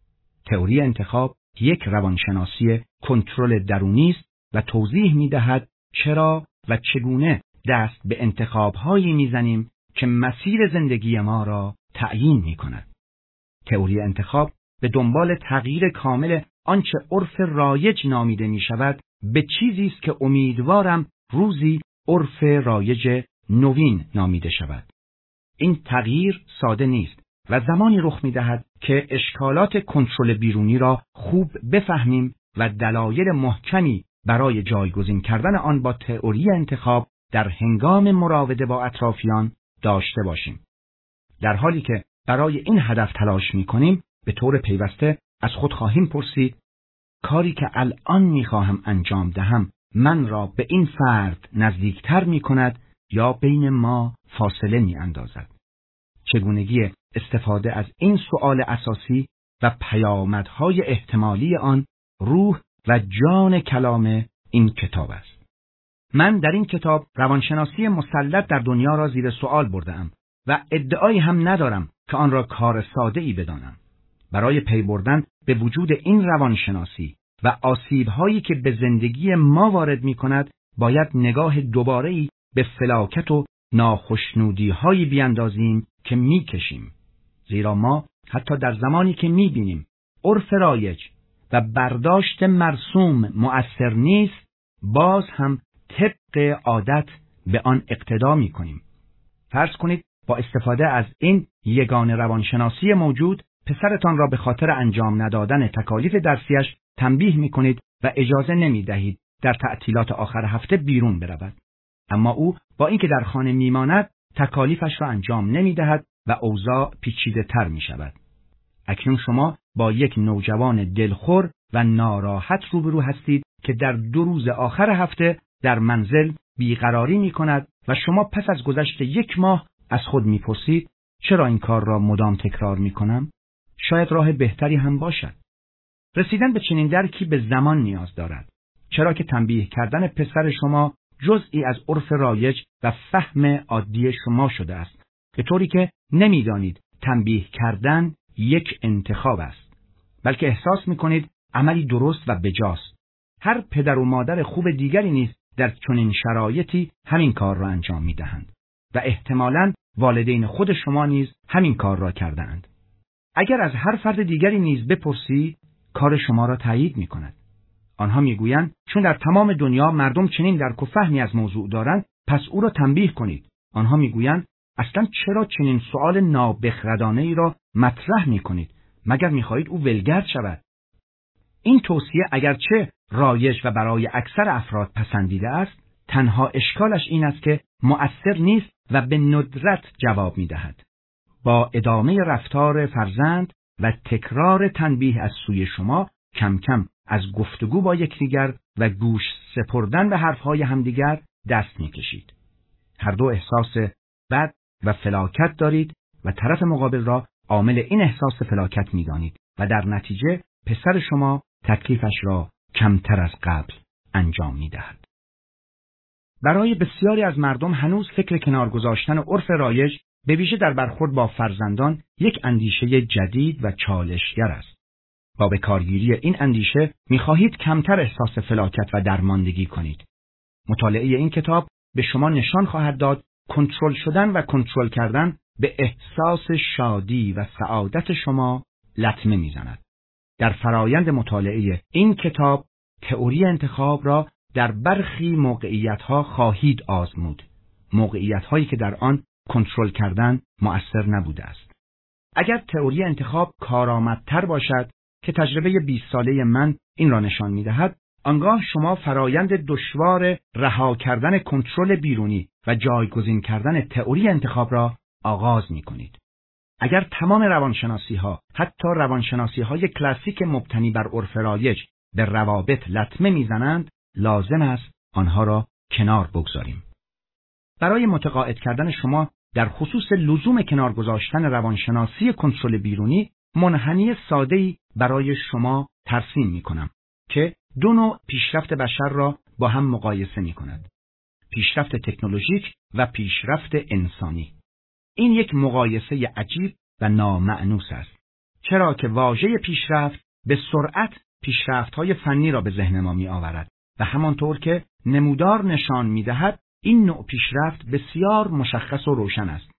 تئوری انتخاب یک روانشناسی کنترل درونی است و توضیح می‌دهد چرا و چگونه دست به انتخاب‌هایی می‌زنیم که مسیر زندگی ما را تعیین می‌کند. تئوری انتخاب به دنبال تغییر کامل آنچه عرف رایج نامیده می‌شود به چیزی است که امیدوارم روزی عرف رایج نوین نامیده شود. این تغییر ساده نیست و زمانی رخ می‌دهد که اشکالات کنترل بیرونی را خوب بفهمیم و دلایل محکمی برای جایگزین کردن آن با تئوری انتخاب در هنگام مراوده با اطرافیان داشته باشیم. در حالی که برای این هدف تلاش می‌کنیم، به طور پیوسته از خود خواهیم پرسید: کاری که الان می‌خواهم انجام دهم من را به این فرد نزدیکتر می‌کند یا بین ما فاصله می‌اندازد؟ چگونگی استفاده از این سؤال اساسی و پیامدهای احتمالی آن روح و جان کلام این کتاب است. من در این کتاب روانشناسی مسلط در دنیا را زیر سؤال بردم و ادعایی هم ندارم که آن را کار ساده‌ای بدانم. برای پی بردن به وجود این روانشناسی و آسیب‌هایی که به زندگی ما وارد می‌کند، باید نگاه دوباره‌ای به فلاکت و ناخشنودی‌هایی بیاندازیم که می‌کشیم. زیرا ما حتی در زمانی که می‌بینیم عرف رایج و برداشت مرسوم مؤثر نیست، باز هم طبق عادت به آن اقتدا می‌کنیم. فرض کنید با استفاده از این یگان روانشناسی موجود، پسرتان را به خاطر انجام ندادن تکالیف درسیش تنبیه می‌کنید و اجازه نمی‌دهید در تعطیلات آخر هفته بیرون برود. اما او با اینکه در خانه میماند تکالیفش را انجام نمی‌دهد و اوضاع پیچیده‌تر می‌شود. اکنون شما با یک نوجوان دلخور و ناراحت روبرو هستید که در دو روز آخر هفته در منزل بیقراری می‌کند و شما پس از گذشت یک ماه از خود می‌پرسید: چرا این کار را مدام تکرار می‌کنم؟ شاید راه بهتری هم باشد. رسیدن به چنین درکی به زمان نیاز دارد، چرا که تنبیه کردن پسر شما جزئی از عرف رایج و فهم عادی شما شده است، به طوری که نمی‌دانید تنبیه کردن یک انتخاب است. بلکه احساس می‌کنید عملی درست و بجاست. هر پدر و مادر خوب دیگری نیز در چنین شرایطی همین کار را انجام می‌دهند و احتمالاً والدین خود شما نیز همین کار را کردند. اگر از هر فرد دیگری نیز بپرسی، کار شما را تایید می‌کند. آنها می‌گویند چون در تمام دنیا مردم چنین درک و فهمی از موضوع دارند، پس او را تنبیه کنید. آنها می‌گویند اصلاً چرا چنین سؤال نابخردانه‌ای را مطرح می‌کنید؟ مگر می‌خواهید او ولگرد شود؟ این توصیه اگرچه رایج و برای اکثر افراد پسندیده است، تنها اشکالش این است که مؤثر نیست و به ندرت جواب می‌دهد. با ادامه رفتار فرزند و تکرار تنبیه از سوی شما، کم کم از گفتگو با یکدیگر و گوش سپردن به حرفهای همدیگر دست می‌کشید. هر دو احساس بد و فلاکت دارید و طرف مقابل را عامل این احساس فلاکت می‌دانید و در نتیجه پسر شما تکلیفش را کمتر از قبل انجام می‌دهد. برای بسیاری از مردم هنوز فکر کنار گذاشتن عرف رایج به ویژه در برخورد با فرزندان یک اندیشه جدید و چالشگر است. با به کارگیری این اندیشه می‌خواهید کمتر احساس فلاکت و درماندگی کنید. مطالعه این کتاب به شما نشان خواهد داد کنترل شدن و کنترل کردن به احساس شادی و سعادت شما لطمه می‌زند. در فرایند مطالعه این کتاب تئوری انتخاب را در برخی موقعیت‌ها خواهید آزمود. موقعیت‌هایی که در آن کنترل کردن مؤثر نبوده است. اگر تئوری انتخاب کارآمدتر باشد که تجربه بیست ساله من این را نشان می‌دهد، آنگاه شما فرایند دشوار رها کردن کنترل بیرونی و جایگزین کردن تئوری انتخاب را آغاز می‌کنید. اگر تمام روانشناسی‌ها، حتی روانشناسی‌های کلاسیک مبتنی بر عرف رایج، به روابط لطمه می‌زنند، لازم است آنها را کنار بگذاریم. برای متقاعد کردن شما در خصوص لزوم کنار گذاشتن روانشناسی کنترل بیرونی، منحنی ساده‌ای برای شما ترسیم می‌کنم که دو نوع پیشرفت بشر را با هم مقایسه می‌کند: پیشرفت تکنولوژیک و پیشرفت انسانی. این یک مقایسه عجیب و نامأنوس است، چرا که واژه پیشرفت به سرعت پیشرفت‌های فنی را به ذهن ما می‌آورد و همانطور که نمودار نشان می‌دهد این نوع پیشرفت بسیار مشخص و روشن است.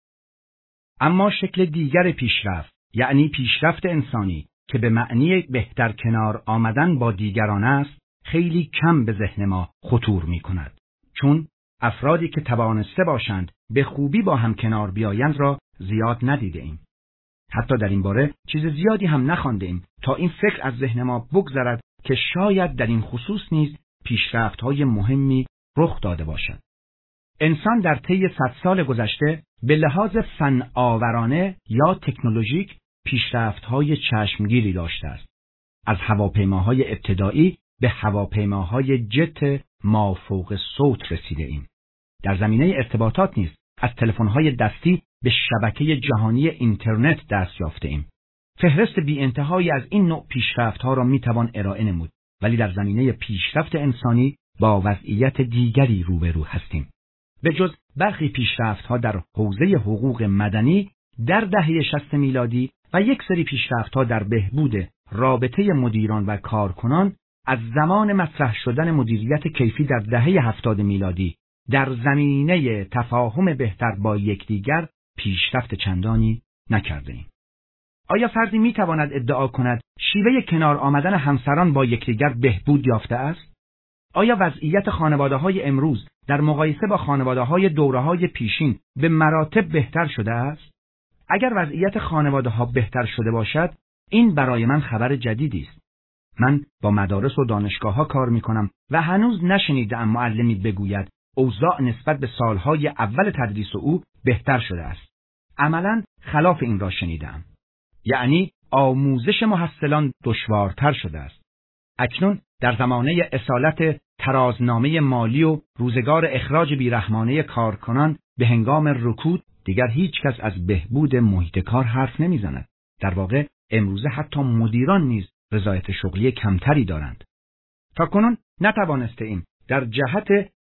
اما شکل دیگر پیشرفت، یعنی پیشرفت انسانی که به معنی بهتر کنار آمدن با دیگران است، خیلی کم به ذهن ما خطور می‌کند، چون افرادی که توانسته باشند به خوبی با هم کنار بیایند را زیاد ندیده ایم. حتی در این باره چیز زیادی هم نخوانده ایم تا این فکر از ذهن ما بگذرد که شاید در این خصوص نیز پیشرفت‌های مهمی رخ داده باشد. انسان در طی صد سال گذشته به لحاظ فن آورانه یا تکنولوژیک پیشرفت‌های چشمگیری داشته است. از هواپیماهای ابتدایی به هواپیماهای جت مافوق صوت رسیده ایم. در زمینه ارتباطات نیز از تلفن‌های دستی به شبکه جهانی اینترنت دست یافته ایم. فهرست بی انتهایی از این نوع پیشرفت‌ها را می‌توان ارائه نمود، ولی در زمینه پیشرفت انسانی با وضعیت دیگری روبرو هستیم. به جز برخی پیشرفت‌ها در حوزه حقوق مدنی در دهه شصت میلادی و یک سری پیشرفت‌ها در بهبود رابطه مدیران و کارکنان از زمان مطرح شدن مدیریت کیفی در دهه هفتاد میلادی در زمینه تفاهم بهتر با یکدیگر پیشرفت چندانی نکرده‌ایم. آیا فردی می‌تواند ادعا کند شیوه کنار آمدن همسران با یکدیگر بهبود یافته است؟ آیا وضعیت خانواده‌های امروز در مقایسه با خانواده‌های دوره‌های پیشین به مراتب بهتر شده است؟ اگر وضعیت خانواده‌ها بهتر شده باشد، این برای من خبر جدیدی است. من با مدارس و دانشگاه‌ها کار می‌کنم و هنوز نشنیدم معلمی بگوید اوضاع نسبت به سالهای اول تدریس او بهتر شده است. عملاً خلاف این را شنیدم. یعنی آموزش محصلان دشوارتر شده است. اکنون در زمانه اصالت ترازنامه مالی و روزگار اخراج بیرحمانه کارکنان به هنگام رکود، دیگر هیچ کس از بهبود محیط کار حرف نمیزند. در واقع امروزه حتی مدیران نیز رضایت شغلی کمتری دارند. تاکنون نتوانسته ایم در جهت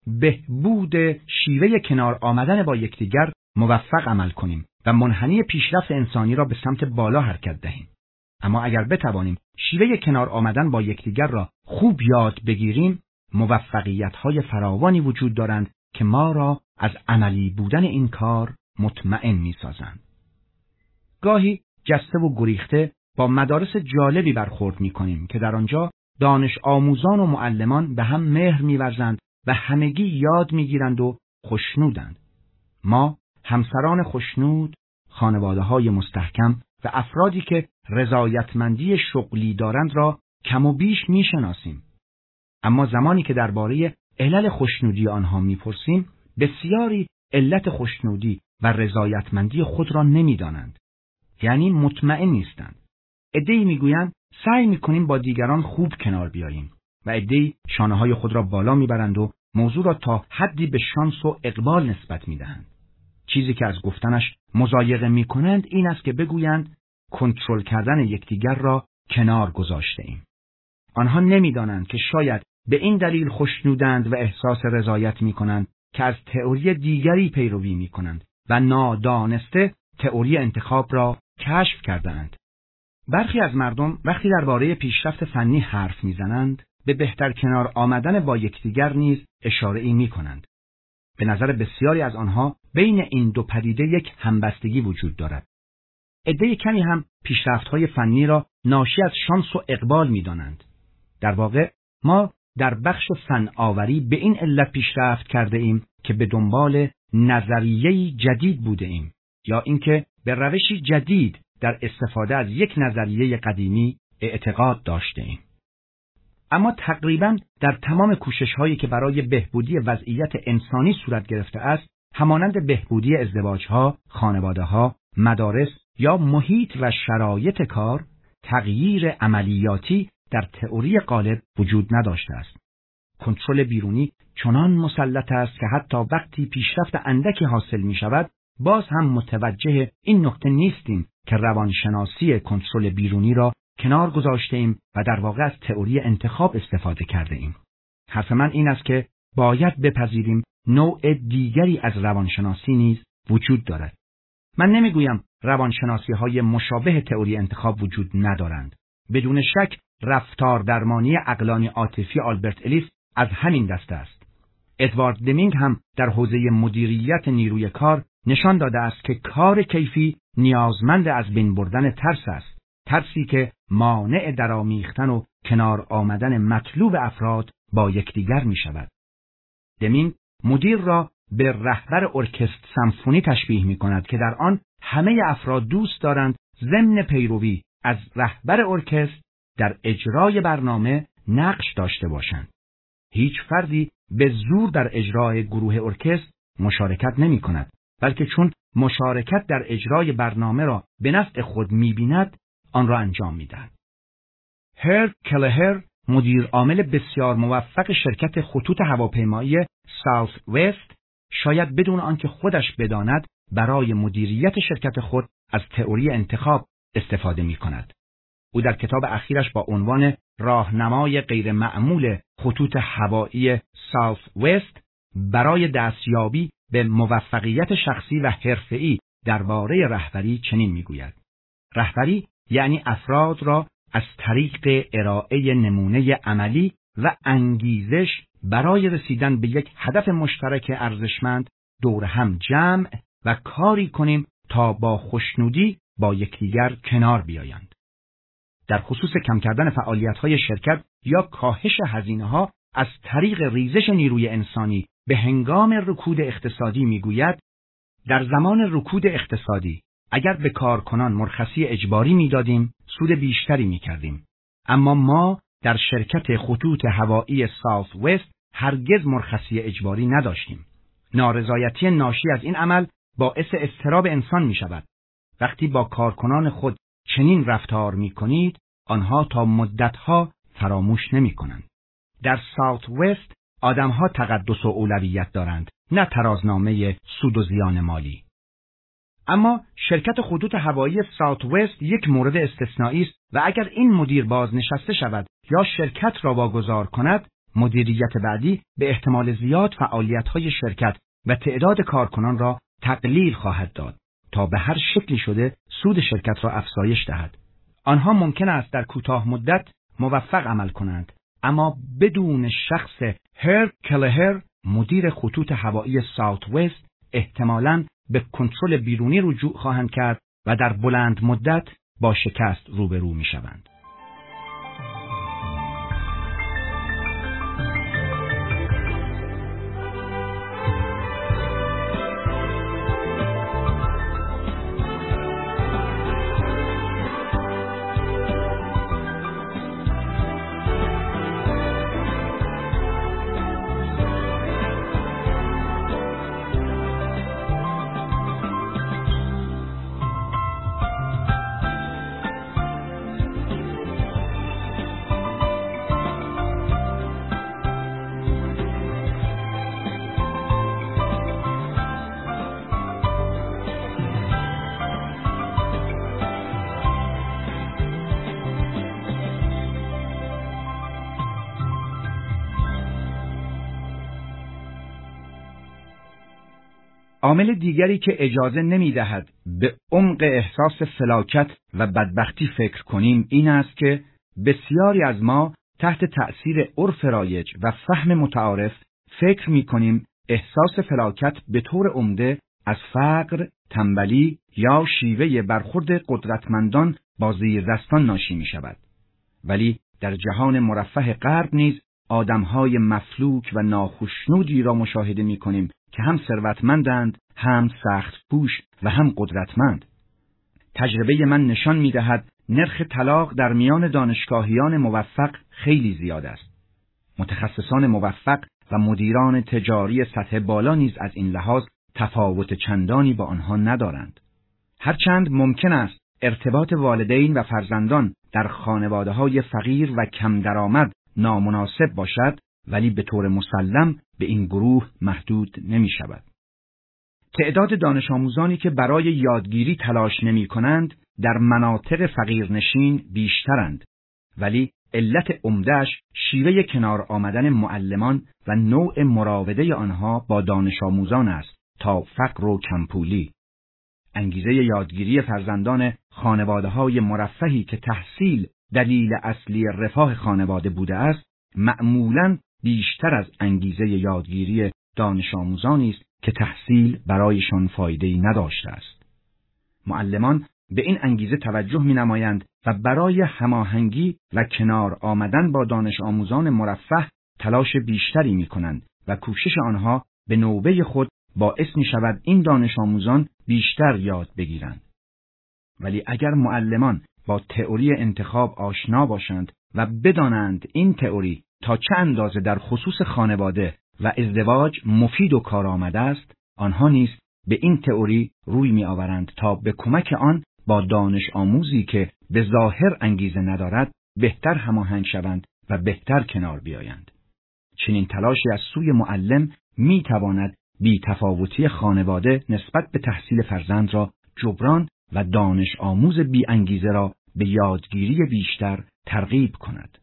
بهبود شیوه کنار آمدن با یکدیگر موفق عمل کنیم و منحنی پیشرفت انسانی را به سمت بالا حرکت دهیم. اما اگر بتوانیم شیوه کنار آمدن با یکدیگر را خوب یاد بگیریم، موفقیت‌های فراوانی وجود دارند که ما را از عملی بودن این کار مطمئن می‌سازند. گاهی جسته و گریخته با مدارس جالبی برخورد می‌کنیم که در آنجا دانش آموزان و معلمان به هم مهر می‌ورزند و همگی یاد می‌گیرند و خوشنودند. ما همسران خوشنود، خانواده‌های مستحکم و افرادی که رضایتمندی شغلی دارند را کم و بیش می‌شناسیم. اما زمانی که درباره علل خوشنودی آنها می‌پرسیم، بسیاری علت خوشنودی و رضایتمندی خود را نمی‌دانند. یعنی مطمئن نیستند. عده‌ای می‌گویند سعی می‌کنیم با دیگران خوب کنار بیاییم و عده‌ای شانه‌های خود را بالا می‌برند و موضوع را تا حدی به شانس و اقبال نسبت می‌دهند. چیزی که از گفتنش مضایقه می‌کنند این است که بگویند کنترل کردن یکدیگر را کنار گذاشته‌ایم. آنها نمی‌دانند که شاید به این دلیل خوشنودند و احساس رضایت می‌کنند که از تئوری دیگری پیروی می‌کنند و نادانسته تئوری انتخاب را کشف کرده‌اند. برخی از مردم وقتی درباره پیشرفت فنی حرف می‌زنند، به بهتر کنار آمدن با یکدیگر نیز اشاره‌ای می‌کنند. به نظر بسیاری از آنها بین این دو پدیده یک همبستگی وجود دارد. عده کمی هم پیشرفت‌های فنی را ناشی از شانس و اقبال می‌دانند. در واقع ما در بخش فناوری به این علت پیشرفت کرده ایم که به دنبال نظریه‌ای جدید بوده ایم یا اینکه به روشی جدید در استفاده از یک نظریه قدیمی اعتقاد داشته ایم. اما تقریباً در تمام کوشش‌هایی که برای بهبودی وضعیت انسانی صورت گرفته است، همانند بهبودی ازدواج‌ها، خانواده‌ها، مدارس یا محیط و شرایط کار، تغییر عملیاتی در تئوری غالب وجود نداشته است. کنترل بیرونی چنان مسلط است که حتی وقتی پیشرفت اندکی حاصل می‌شود، باز هم متوجه این نکته نیستیم که روانشناسی کنترل بیرونی را کنار گذاشته ایم و در واقع از تئوری انتخاب استفاده کرده ایم. حرف من این است که باید بپذیریم نوع دیگری از روانشناسی نیز وجود دارد. من نمیگویم روانشناسی‌های مشابه تئوری انتخاب وجود ندارند. بدون شک رفتار درمانی عقلانی عاطفی آلبرت الیس از همین دسته است. ادوارد دمینگ هم در حوزه مدیریت نیروی کار نشان داده است که کار کیفی نیازمند از بین بردن ترس است. ترسی که مانع درآمیختن و کنار آمدن مطلوب افراد با یکدیگر می شود. دمینگ مدیر را به رهبر ارکستر سمفونی تشبیه می کند که در آن همه افراد دوست دارند ضمن پیروی از رهبر ارکستر در اجرای برنامه نقش داشته باشند. هیچ فردی به زور در اجرای گروه ارکستر مشارکت نمی کند، بلکه چون مشارکت در اجرای برنامه را به نفع خود می بیند، آن را انجام می دهد. هرب کلهر، مدیر عامل بسیار موفق شرکت خطوط هواپیمایی ساوث وست، شاید بدون آنکه خودش بداند برای مدیریت شرکت خود از تئوری انتخاب استفاده می کند. او در کتاب اخیرش با عنوان راهنمای غیر معمول خطوط هوایی ساوث وست برای دستیابی به موفقیت شخصی و حرفه‌ای درباره رهبری چنین میگوید: رهبری یعنی افراد را از طریق ارائه نمونه عملی و انگیزش برای رسیدن به یک هدف مشترک ارزشمند دور هم جمع و کاری کنیم تا با خوشنودی با یکدیگر کنار بیایند. در خصوص کم کردن فعالیت‌های شرکت یا کاهش هزینه‌ها از طریق ریزش نیروی انسانی به هنگام رکود اقتصادی میگوید: در زمان رکود اقتصادی اگر به کارکنان مرخصی اجباری میدادیم سود بیشتری میکردیم، اما ما در شرکت خطوط هوایی ساوث وست هرگز مرخصی اجباری نداشتیم. نارضایتی ناشی از این عمل باعث اضطراب انسان میشود. وقتی با کارکنان خود چنین رفتار میکنید، آنها تا مدتها فراموش نمیکنند. در ساوث وست آدمها تقدس و اولویت دارند، نه ترازنامه سود و زیان مالی. اما شرکت خطوط هوایی ساوث وست یک مورد استثنایی است و اگر این مدیر بازنشسته شود یا شرکت را واگذار کند، مدیریت بعدی به احتمال زیاد فعالیت‌های شرکت و تعداد کارکنان را تقلیل خواهد داد تا به هر شکلی شده سود شرکت را افزایش دهد. آنها ممکن است در کوتاه مدت موفق عمل کنند، اما بدون شخص هرب کلهر مدیر خطوط هوایی ساوت وست احتمالاً به کنترل بیرونی رجوع خواهند کرد و در بلند مدت با شکست روبرو می شوند. عامل دیگری که اجازه نمی دهد به عمق احساس فلاکت و بدبختی فکر کنیم این است که بسیاری از ما تحت تأثیر عرف رایج و فهم متعارف فکر می کنیم احساس فلاکت به طور عمده از فقر، تنبلی یا شیوه برخورد قدرتمندان با زیردستان ناشی می شود. ولی در جهان مرفه غرب نیز آدمهای مفلوک و ناخشنودی را مشاهده می کنیم که هم ثروتمندند، هم سخت پوش و هم قدرتمند. تجربه من نشان می دهد نرخ طلاق در میان دانشگاهیان موفق خیلی زیاد است. متخصصان موفق و مدیران تجاری سطح بالا نیز از این لحاظ تفاوت چندانی با آنها ندارند. هرچند ممکن است ارتباط والدین و فرزندان در خانواده‌های فقیر و کم درآمد نامناسب باشد، ولی به طور مسلم به این گروه محدود نمی شود. تعداد دانش آموزانی که برای یادگیری تلاش نمی کنند در مناطق فقیرنشین بیشترند، ولی علت عمده‌اش شیوه کنار آمدن معلمان و نوع مراوده آنها با دانش آموزان است تا فقر و کمپولی. انگیزه یادگیری فرزندان خانواده‌های مرفهی که تحصیل دلیل اصلی رفاه خانواده بوده است، معمولاً بیشتر از انگیزه یادگیری دانش آموزانی است که تحصیل برایشان فایده‌ای نداشته است. معلمان به این انگیزه توجه می‌نمایند و برای هماهنگی و کنار آمدن با دانش آموزان مرفه تلاش بیشتری می‌کنند و کوشش آنها به نوبه خود باعث می‌شود این دانش آموزان بیشتر یاد بگیرند. ولی اگر معلمان با تئوری انتخاب آشنا باشند و بدانند این تئوری تا چه اندازه در خصوص خانواده و ازدواج مفید و کارآمد است، آنها نیز به این تئوری روی می آورند تا به کمک آن با دانش آموزی که به ظاهر انگیزه ندارد بهتر هماهنگ شوند و بهتر کنار بیایند. چنین تلاشی از سوی معلم می تواند بی تفاوتی خانواده نسبت به تحصیل فرزند را جبران و دانش آموز بی انگیزه را به یادگیری بیشتر ترغیب کند.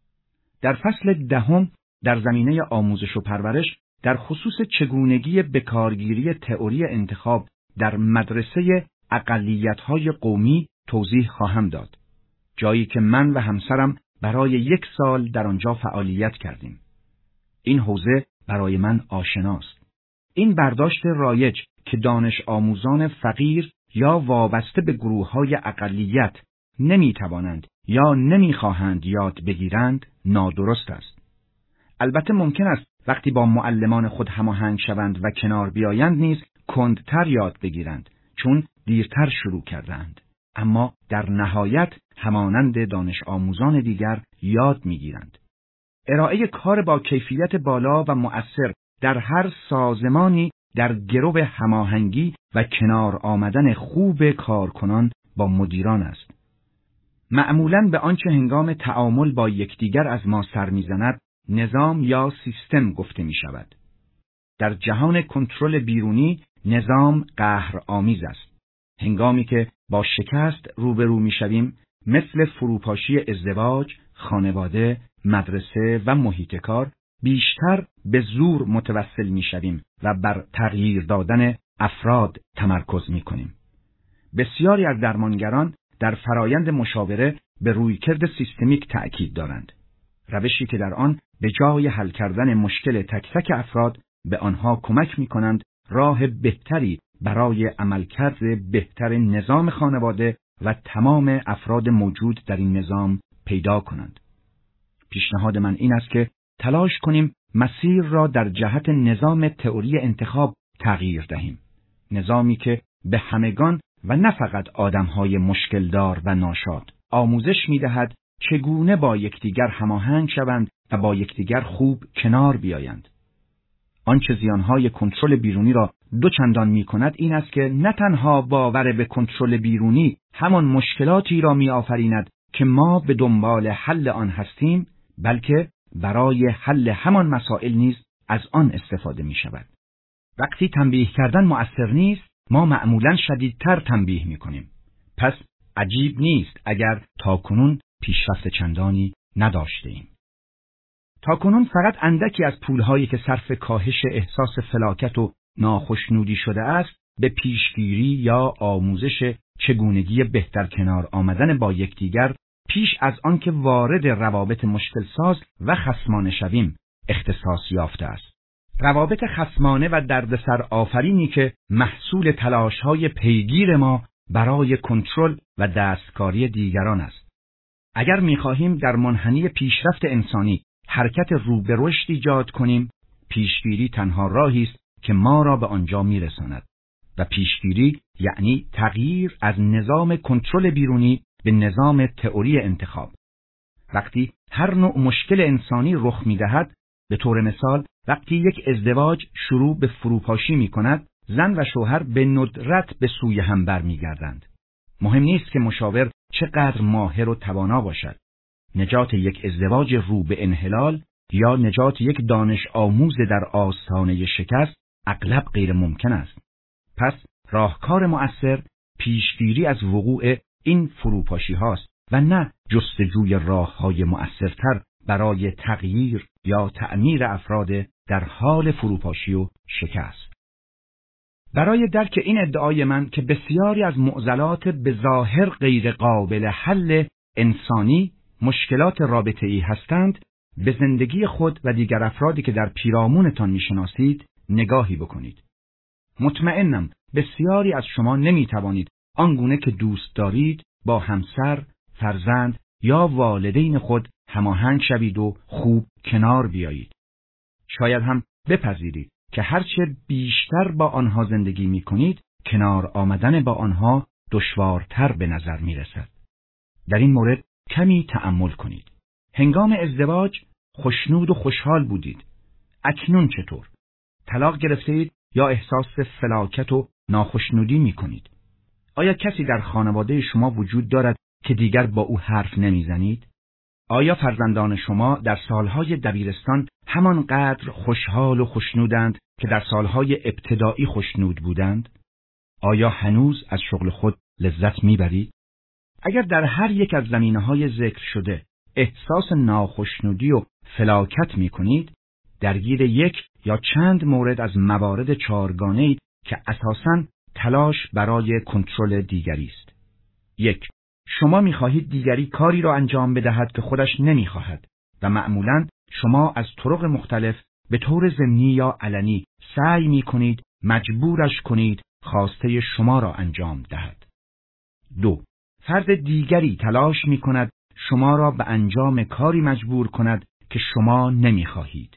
در فصل دهم در زمینه آموزش و پرورش در خصوص چگونگی بکارگیری تئوری انتخاب در مدرسه اقلیت‌های قومی توضیح خواهم داد، جایی که من و همسرم برای یک سال در آنجا فعالیت کردیم. این حوزه برای من آشناست. این برداشت رایج که دانش آموزان فقیر یا وابسته به گروه‌های اقلیت نمی‌توانند یا نمی‌خواهند یاد بگیرند نادرست است. البته ممکن است وقتی با معلمان خود هماهنگ شوند و کنار بیایند نیز کندتر یاد بگیرند، چون دیرتر شروع کردند. اما در نهایت همانند دانش آموزان دیگر یاد می‌گیرند. ارائه کار با کیفیت بالا و مؤثر در هر سازمانی در گرو هماهنگی و کنار آمدن خوب کارکنان با مدیران است. معمولاً به آنچه هنگام تعامل با یکدیگر از ما سر می‌زند نظام یا سیستم گفته می شود. در جهان کنترل بیرونی نظام قهرآمیز است. هنگامی که با شکست روبرو می شویم مثل فروپاشی ازدواج، خانواده، مدرسه و محیط کار بیشتر به زور متوسل می شویم و بر تغییر دادن افراد تمرکز می کنیم. بسیاری از درمانگران در فرایند مشاوره به رویکرد سیستمیک تأکید دارند. روشی که در آن به جای حل کردن مشکل تک تک افراد به آنها کمک می‌کنند راه بهتری برای عملکرد بهتر نظام خانواده و تمام افراد موجود در این نظام پیدا کنند. پیشنهاد من این است که تلاش کنیم مسیر را در جهت نظام تئوری انتخاب تغییر دهیم. نظامی که به همگان و نه فقط آدم‌های مشکلدار و ناشاد آموزش می‌دهد چگونه با یکدیگر هماهنگ شوند و با یکدیگر خوب کنار بیایند. آنچه زیانهای کنترل بیرونی را دو چندان می‌کند این است که نه تنها باور به کنترل بیرونی همان مشکلاتی را می‌آفریند که ما به دنبال حل آن هستیم، بلکه برای حل همان مسائل نیز از آن استفاده می‌شود. وقتی تنبیه کردن مؤثر نیست، ما معمولاً شدیدتر تنبیه می‌کنیم. پس عجیب نیست اگر تاکنون پیشرفت چندانی نداشته‌ایم. تاکنون فقط اندکی از پولهایی که صرف کاهش احساس فلاکت و ناخشنودی شده است به پیشگیری یا آموزش چگونگی بهتر کنار آمدن با یکدیگر پیش از آن که وارد روابط مشکل ساز و خصمانه شویم اختصاص یافته است. روابط خصمانه و دردسر آفرینی که محصول تلاش‌های پیگیر ما برای کنترل و دستکاری دیگران است. اگر می‌خواهیم در منحنی پیشرفت انسانی حرکت رو به رشد ایجاد کنیم، پیشگیری تنها راهی است که ما را به آنجا می‌رساند. و پیشگیری یعنی تغییر از نظام کنترل بیرونی به نظام تئوری انتخاب. وقتی هر نوع مشکل انسانی رخ می‌دهد، به طور مثال وقتی یک ازدواج شروع به فروپاشی می‌کند، زن و شوهر به ندرت به سوی هم برمیگردند. مهم نیست که مشاور چقدر ماهر و توانا باشد. نجات یک ازدواج رو به انحلال یا نجات یک دانش آموز در آستانه شکست اغلب غیر ممکن است. پس راهکار مؤثر پیشگیری از وقوع این فروپاشی هاست و نه جستجوی راه‌های مؤثرتر برای تغییر یا تعمیر افراد در حال فروپاشی و شکست. برای درک این ادعای من که بسیاری از معضلات به ظاهر غیر قابل حل انسانی مشکلات رابطه‌ای هستند، به زندگی خود و دیگر افرادی که در پیرامونتان می‌شناسید نگاهی بکنید. مطمئنم بسیاری از شما نمی‌توانید آنگونه که دوست دارید با همسر، فرزند یا والدین خود هماهنگ شوید و خوب کنار بیایید. شاید هم بپذیرید که هرچه بیشتر با آنها زندگی می‌کنید، کنار آمدن با آنها دشوارتر به نظر می‌رسد. در این مورد کمی تأمل کنید. هنگام ازدواج خوشنود و خوشحال بودید. اکنون چطور؟ طلاق گرفتید یا احساس فلاکت و ناخشنودی می‌کنید؟ آیا کسی در خانواده شما وجود دارد که دیگر با او حرف نمی‌زنید؟ آیا فرزندان شما در سالهای دبیرستان همانقدر خوشحال و خوشنودند که در سالهای ابتدایی خوشنود بودند؟ آیا هنوز از شغل خود لذت می‌برید؟ اگر در هر یک از زمینه‌های ذکر شده احساس ناخشنودی و فلاکت می‌کنید، درگیر یک یا چند مورد از موارد چهارگانه‌ای که اساساً تلاش برای کنترل دیگری است. یک، شما می‌خواهید دیگری کاری را انجام بدهد که خودش نمی‌خواهد و معمولاً شما از طرق مختلف به طور ضمنی یا علنی سعی می‌کنید مجبورش کنید خواسته شما را انجام دهد. دو، فرد دیگری تلاش می‌کند شما را به انجام کاری مجبور کند که شما نمی‌خواهید.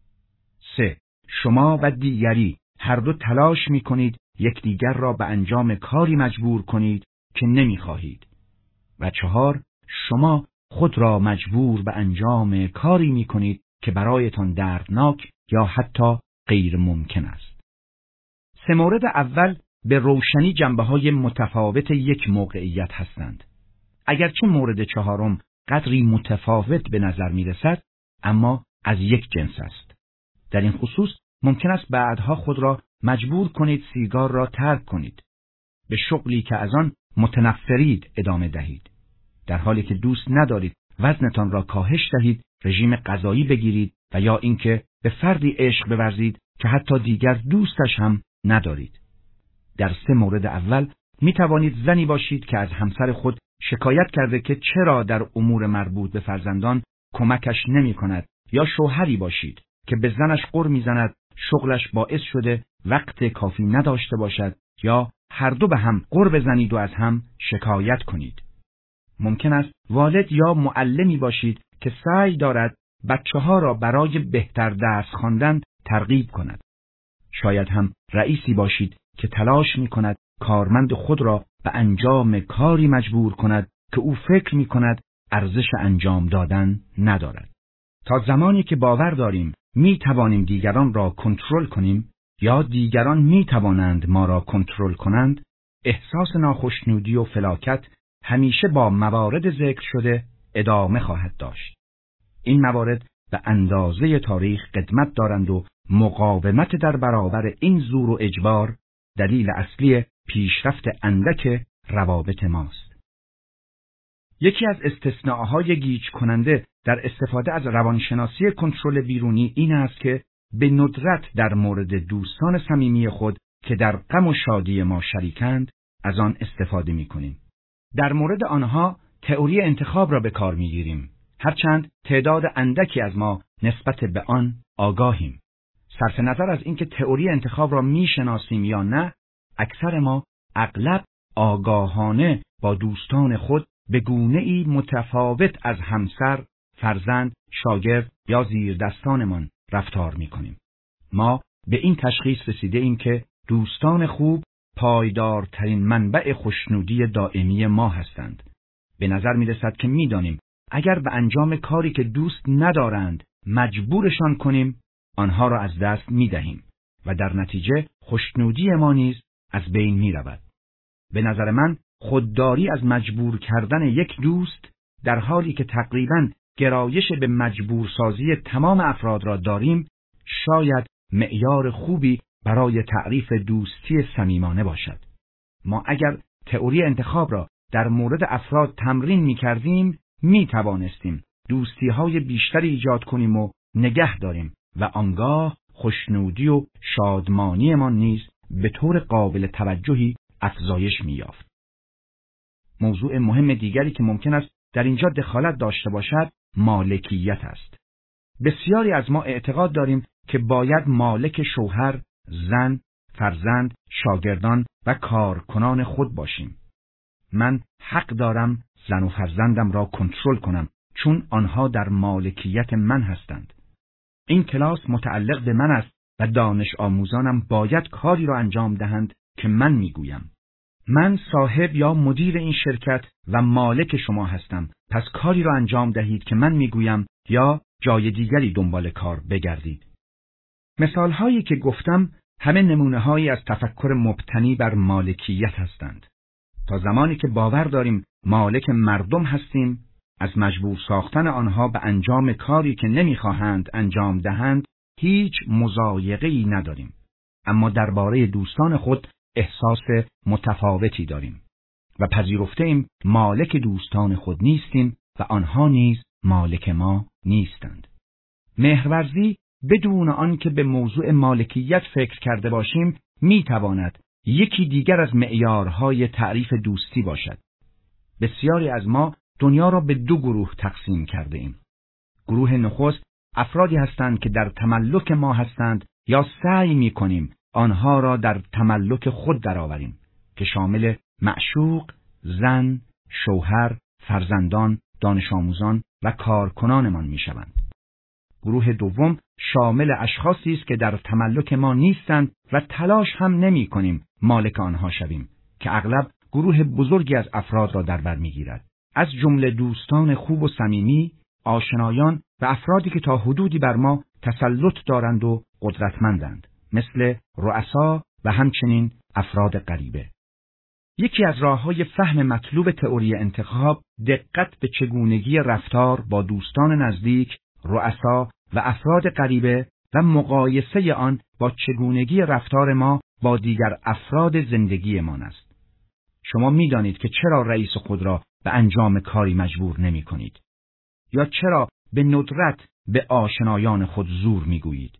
سه، شما و دیگری هر دو تلاش می‌کنید یکدیگر را به انجام کاری مجبور کنید که نمی‌خواهید. و چهار، شما خود را مجبور به انجام کاری می‌کنید که برایتان دردناک یا حتی غیر ممکن است. سه مورد اول به روشنی جنبه‌های متفاوت یک موقعیت هستند. اگرچه مورد چهارم قدری متفاوت به نظر می‌رسد، اما از یک جنس است. در این خصوص ممکن است بعدها خود را مجبور کنید سیگار را ترک کنید، به شغلی که از آن متنفرید ادامه دهید، در حالی که دوست ندارید وزنتان را کاهش دهید، رژیم غذایی بگیرید و یا اینکه به فردی عشق بورزید که حتی دیگر دوستش هم ندارید. در سه مورد اول می توانید زنی باشید که از همسر خود شکایت کرده که چرا در امور مربوط به فرزندان کمکش نمی کند، یا شوهری باشید که به زنش غر می زند، شغلش باعث شده وقت کافی نداشته باشد، یا هر دو به هم غر بزنید و از هم شکایت کنید. ممکن است والد یا معلمی باشید که سعی دارد بچه ها را برای بهتر درس خواندن ترغیب کند. شاید هم رئیسی باشید که تلاش می کند کارمند خود را به انجام کاری مجبور کند که او فکر می کند ارزش انجام دادن ندارد. تا زمانی که باور داریم می توانیم دیگران را کنترل کنیم یا دیگران می توانند ما را کنترل کنند، احساس ناخوشنودی و فلاکت همیشه با موارد ذکر شده ادامه خواهد داشت. این موارد به اندازه تاریخ قدمت دارند و مقاومت در برابر این زور و اجبار دلیل اصلی پیشرفت اندک روابط ماست. یکی از استثناءهای گیج کننده در استفاده از روانشناسی کنترل بیرونی این است که به ندرت در مورد دوستان صمیمی خود که در غم و شادی ما شریکند از آن استفاده می‌کنیم. در مورد آنها تئوری انتخاب را به کار می‌گیریم، هرچند تعداد اندکی از ما نسبت به آن آگاهیم. صرف نظر از اینکه تئوری انتخاب را می‌شناسیم یا نه، اکثر ما اغلب آگاهانه با دوستان خود به گونه‌ای متفاوت از همسر، فرزند، شاگرد یا زیردستانمان رفتار می‌کنیم. ما به این تشخیص رسیده ایم که دوستان خوب پایدارترین منبع خوشنودی دائمی ما هستند. به نظر می‌رسد که می‌دانیم اگر به انجام کاری که دوست ندارند مجبورشان کنیم، آنها را از دست می‌دهیم و در نتیجه خوشنودی ما نیز از بین می‌رود. به نظر من خودداری از مجبور کردن یک دوست در حالی که تقریباً گرایش به مجبورسازی تمام افراد را داریم، شاید معیار خوبی برای تعریف دوستی صمیمانه باشد. ما اگر تئوری انتخاب را در مورد افراد تمرین می کردیم، می توانستیم دوستی های بیشتری ایجاد کنیم و نگه داریم و آنگاه خوشنودی و شادمانی ما نیز به طور قابل توجهی افزایش می یافت. موضوع مهم دیگری که ممکن است در اینجا دخالت داشته باشد، مالکیت است. بسیاری از ما اعتقاد داریم که باید مالک شوهر، زن، فرزند، شاگردان و کارکنان خود باشیم. من حق دارم زن و فرزندم را کنترل کنم چون آنها در مالکیت من هستند. این کلاس متعلق به من است و دانش آموزانم باید کاری را انجام دهند که من میگویم. من صاحب یا مدیر این شرکت و مالک شما هستم، پس کاری را انجام دهید که من میگویم یا جای دیگری دنبال کار بگردید. مثال هایی که گفتم همه نمونه هایی از تفکر مبتنی بر مالکیت هستند. تا زمانی که باور داریم مالک مردم هستیم، از مجبور ساختن آنها به انجام کاری که نمیخواهند انجام دهند هیچ مضایقه‌ای نداریم. اما درباره دوستان خود احساس متفاوتی داریم و پذیرفته ایم مالک دوستان خود نیستیم و آنها نیز مالک ما نیستند. مهرورزی بدون آنکه به موضوع مالکیت فکر کرده باشیم میتواند یکی دیگر از معیارهای تعریف دوستی باشد. بسیاری از ما دنیا را به دو گروه تقسیم کرده ایم. گروه نخست افرادی هستند که در تملک ما هستند یا سعی میکنیم آنها را در تملک خود درآوریم که شامل معشوق، زن، شوهر، فرزندان، دانش آموزان و کارکنانمان میشوند. گروه دوم شامل اشخاصی است که در تملک ما نیستند و تلاش هم نمی کنیم مالک آنها شویم که اغلب گروه بزرگی از افراد را در بر میگیرد، از جمله دوستان خوب و صمیمی، آشنایان و افرادی که تا حدودی بر ما تسلط دارند و قدرتمندند، مثل رؤسا و همچنین افراد غریبه. یکی از راه‌های فهم مطلوب تئوری انتخاب دقت به چگونگی رفتار با دوستان نزدیک، رؤسا و افراد غریبه و مقایسه آن با چگونگی رفتار ما با دیگر افراد زندگیمان است. شما می‌دانید که چرا رئیس خود را به انجام کاری مجبور نمی کنید یا چرا به ندرت به آشنایان خود زور می‌گویید.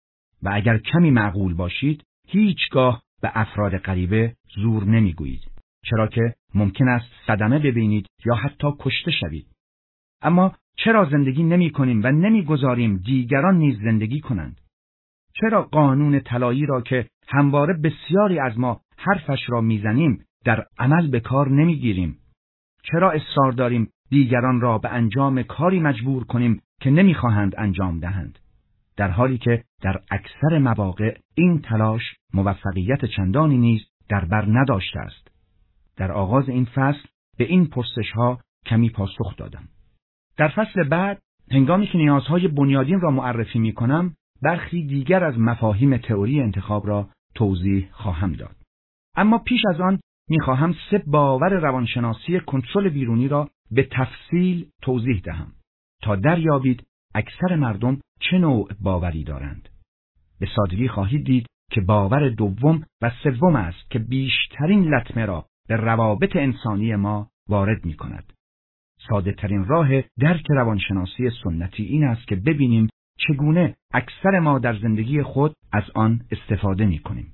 و اگر کمی معقول باشید هیچگاه به افراد غریبه زور نمی‌گویید. چرا که ممکن است صدمه ببینید یا حتی کشته شوید. اما چرا زندگی نمی کنیم و نمی گذاریم دیگران نیز زندگی کنند؟ چرا قانون طلایی را که همواره بسیاری از ما حرفش را میزنیم در عمل به کار نمی گیریم؟ چرا اصرار داریم دیگران را به انجام کاری مجبور کنیم که نمیخواهند انجام دهند، در حالی که در اکثر مواقع این تلاش موفقیت چندانی نیز در بر نداشته است؟ در آغاز این فصل به این پرسش‌ها کمی پاسخ دادم. در فصل بعد، هنگامی که نیازهای بنیادین را معرفی می‌کنم، برخی دیگر از مفاهیم تئوری انتخاب را توضیح خواهم داد. اما پیش از آن می‌خواهم سه باور روانشناسی کنترل بیرونی را به تفصیل توضیح دهم تا دریابید اکثر مردم چه نوع باوری دارند. به سادگی خواهید دید که باور دوم و سوم است که بیشترین لطمه را به روابط انسانی ما وارد می‌کند. ساده ترین راه درک روانشناسی سنتی این است که ببینیم چگونه اکثر ما در زندگی خود از آن استفاده می‌کنیم.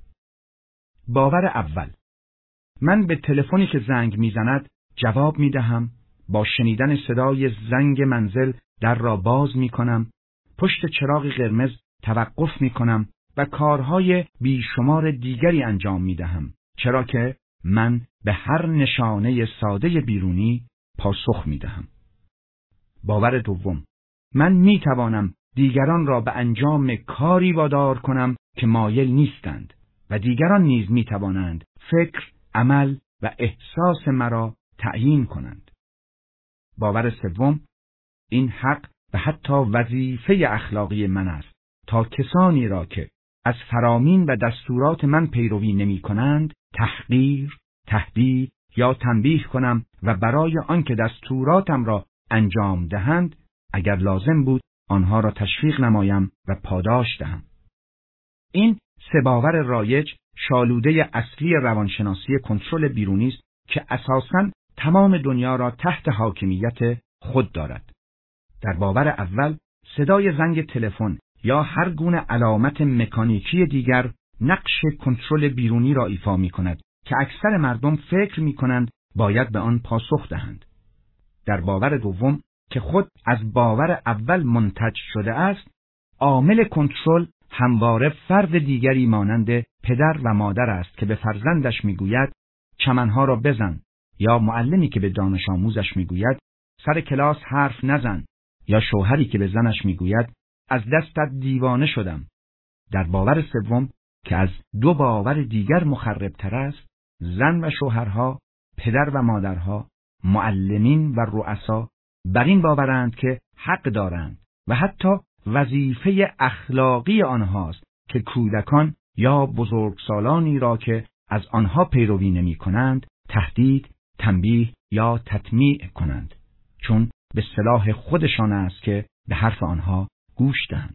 باور اول: من به تلفنی که زنگ می‌زند جواب می‌دهم، با شنیدن صدای زنگ منزل در را باز می‌کنم، پشت چراغ قرمز توقف می‌کنم و کارهای بیشمار دیگری انجام می‌دهم، چرا که من به هر نشانه ساده بیرونی پاسخ می‌دهم. باور دوم: من می‌توانم دیگران را به انجام کاری وادار کنم که مایل نیستند و دیگران نیز می‌توانند فکر، عمل و احساس مرا تعیین کنند. باور سوم: این حق و حتی وظیفه اخلاقی من است تا کسانی را که از فرامین و دستورات من پیروی نمی کنند تحقیر، تهدید یا تنبیه کنم و برای آنکه دستوراتم را انجام دهند اگر لازم بود آنها را تشویق نمایم و پاداش دهم. این سه باور رایج شالوده اصلی روانشناسی کنترل بیرونی است که اساساً تمام دنیا را تحت حاکمیت خود دارد. در باور اول، صدای زنگ تلفن یا هر گونه علامت مکانیکی دیگر نقش کنترل بیرونی را ایفا می کند که اکثر مردم فکر می کنند باید به آن پاسخ دهند. در باور دوم که خود از باور اول منتج شده است، عامل کنترل همواره فرد دیگری مانند پدر و مادر است که به فرزندش می گوید چمنها را بزن، یا معلمی که به دانش آموزش می گوید سر کلاس حرف نزن، یا شوهری که به زنش می گوید از دستت دیوانه شدم. در باور سوم که از دو باور دیگر مخربتر است، زن و شوهرها، پدر و مادرها، معلمین و رؤسا بر این باورند که حق دارند و حتی وظیفه اخلاقی آنهاست که کودکان یا بزرگسالانی را که از آنها پیروی نمی کنند تهدید، تنبیه یا تطمیع کنند، چون به صلاح خودشان است که به حرف آنها گوش دهند.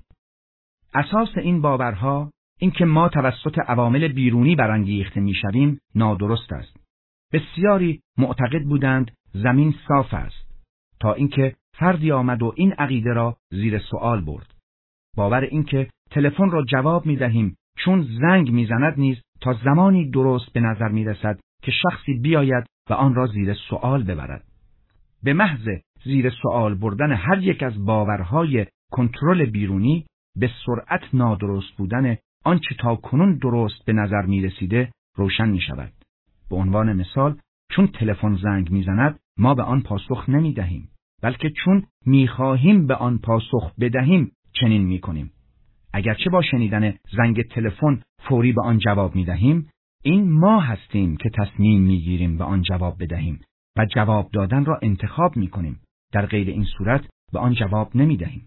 اساس این باورها این که ما توسط عوامل بیرونی برانگیخته میشویم نادرست است. بسیاری معتقد بودند زمین صاف است تا اینکه فردی آمد و این عقیده را زیر سوال برد. باور این که تلفن را جواب می‌دهیم چون زنگ می‌زند نیز تا زمانی درست به نظر می‌رسد که شخصی بیاید و آن را زیر سوال ببرد. به محض زیر سوال بردن هر یک از باورهای کنترل بیرونی به سرعت نادرست بودن آنچه تا کنون درست به نظر می‌رسیده روشن می‌شود. به عنوان مثال، چون تلفن زنگ می‌زند ما به آن پاسخ نمی‌دهیم، بلکه چون می‌خواهیم به آن پاسخ بدهیم چنین می‌کنیم. اگرچه با شنیدن زنگ تلفن فوری به آن جواب می‌دهیم، این ما هستیم که تصمیم می‌گیریم به آن جواب بدهیم و جواب دادن را انتخاب می‌کنیم. در غیر این صورت به آن جواب نمی‌دهیم.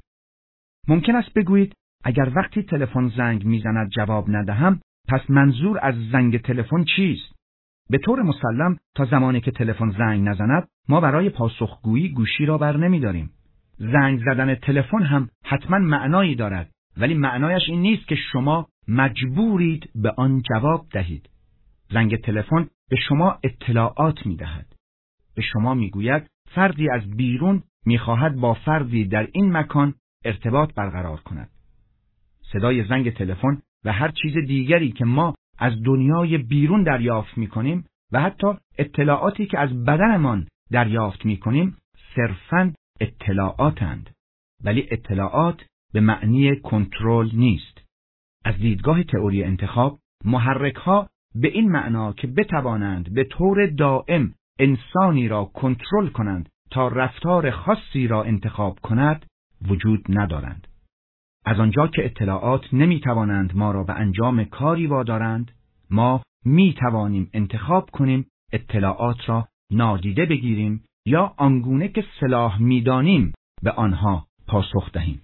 ممکن است بگویید اگر وقتی تلفن زنگ می‌زند جواب ندهم، پس منظور از زنگ تلفن چیست؟ به طور مسلم تا زمانی که تلفن زنگ نزند ما برای پاسخگویی گوشی را بر نمی‌داریم. زنگ زدن تلفن هم حتما معنایی دارد، ولی معنایش این نیست که شما مجبورید به آن جواب دهید. زنگ تلفن به شما اطلاعات می‌دهد. به شما می‌گوید فردی از بیرون می‌خواهد با فردی در این مکان ارتباط برقرار کند. صدای زنگ تلفن و هر چیز دیگری که ما از دنیای بیرون دریافت می‌کنیم و حتی اطلاعاتی که از بدنمان دریافت می‌کنیم صرفاً اطلاعاتند، ولی اطلاعات به معنی کنترل نیست. از دیدگاه تئوری انتخاب، محرک‌ها به این معنا که بتوانند به طور دائم انسانی را کنترل کنند تا رفتار خاصی را انتخاب کند وجود ندارند. از آنجا که اطلاعات نمی‌توانند ما را به انجام کاری وادارند، ما می‌توانیم انتخاب کنیم اطلاعات را نادیده بگیریم یا آنگونه که صلاح می‌دانیم به آنها پاسخ دهیم.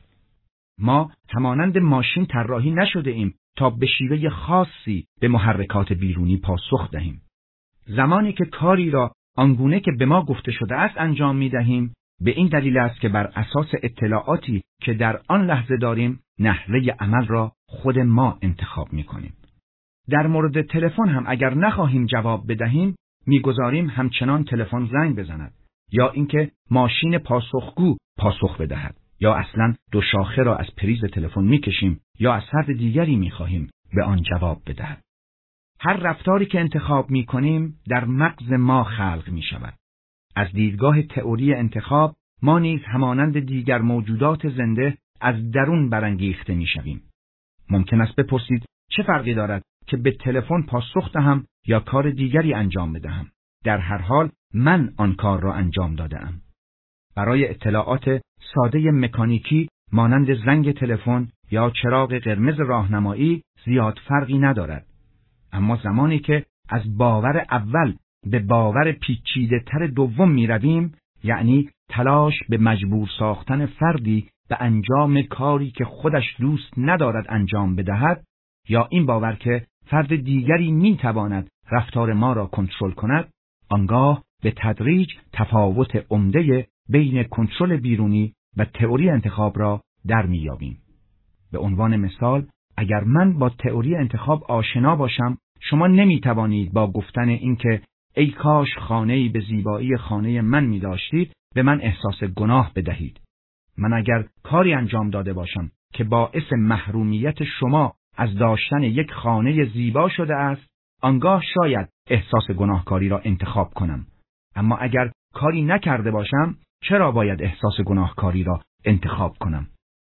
ما همانند ماشین طراحی نشده ایم تا به شیوه خاصی به محرکات بیرونی پاسخ دهیم. زمانی که کاری را آنگونه که به ما گفته شده است انجام می‌دهیم، به این دلیل است که بر اساس اطلاعاتی که در آن لحظه داریم، نحوه عمل را خود ما انتخاب می‌کنیم. در مورد تلفن هم اگر نخواهیم جواب بدهیم، می‌گذاریم همچنان تلفن زنگ بزند، یا اینکه ماشین پاسخگو پاسخ بدهد، یا اصلاً دو شاخه را از پریز تلفن می‌کشیم یا از فرد دیگری می‌خواهیم به آن جواب بدهد. هر رفتاری که انتخاب می‌کنیم در مغز ما خلق می‌شود. از دیدگاه تئوری انتخاب، ما نیز همانند دیگر موجودات زنده از درون برانگیخته می‌شویم. ممکن است بپرسید چه فرقی دارد که به تلفن پاسخ دهم یا کار دیگری انجام بدهم؟ در هر حال من آن کار را انجام داده‌ام. برای اطلاعات ساده مکانیکی مانند زنگ تلفن یا چراغ قرمز راهنمایی زیاد فرقی ندارد. اما زمانی که از باور اول به باور پیچیده تر دوم می رویم، یعنی تلاش به مجبور ساختن فردی به انجام کاری که خودش دوست ندارد انجام بدهد، یا این باور که فرد دیگری می تواند رفتار ما را کنترل کند، آنگاه به تدریج تفاوت عمده بین کنترل بیرونی و تئوری انتخاب را در می یابیم. به عنوان مثال، اگر من با تئوری انتخاب آشنا باشم، شما نمی توانید با گفتن اینکه ای کاش خانه‌ای به زیبایی خانه من می داشتید به من احساس گناه بدهید. من اگر کاری انجام داده باشم که باعث محرومیت شما از داشتن یک خانه زیبا شده است، آنگاه شاید احساس گناهکاری را انتخاب کنم. اما اگر کاری نکرده باشم، چرا باید احساس گناهکاری را انتخاب کنم؟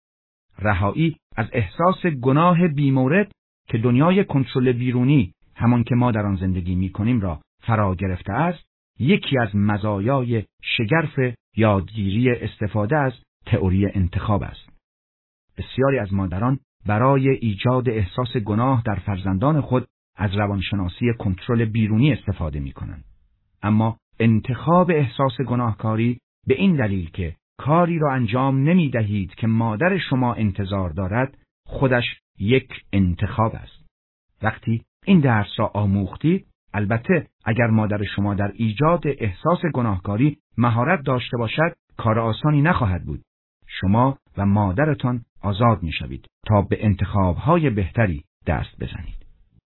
رهایی از احساس گناه بیمورد که دنیای کنترل بیرونی، همان که ما در آن زندگی می کنیم، را فرا گرفته است، یکی از مزایای شگرف یادگیری استفاده از تئوری انتخاب است. بسیاری از مادران برای ایجاد احساس گناه در فرزندان خود از روانشناسی کنترل بیرونی استفاده می کنند. اما انتخاب احساس گناهکاری به این دلیل که کاری را انجام نمی دهید که مادر شما انتظار دارد، خودش یک انتخاب است. وقتی این درس را آموختید، البته اگر مادر شما در ایجاد احساس گناهکاری مهارت داشته باشد، کار آسانی نخواهد بود. شما و مادرتان آزاد می شوید تا به انتخاب‌های بهتری دست بزنید.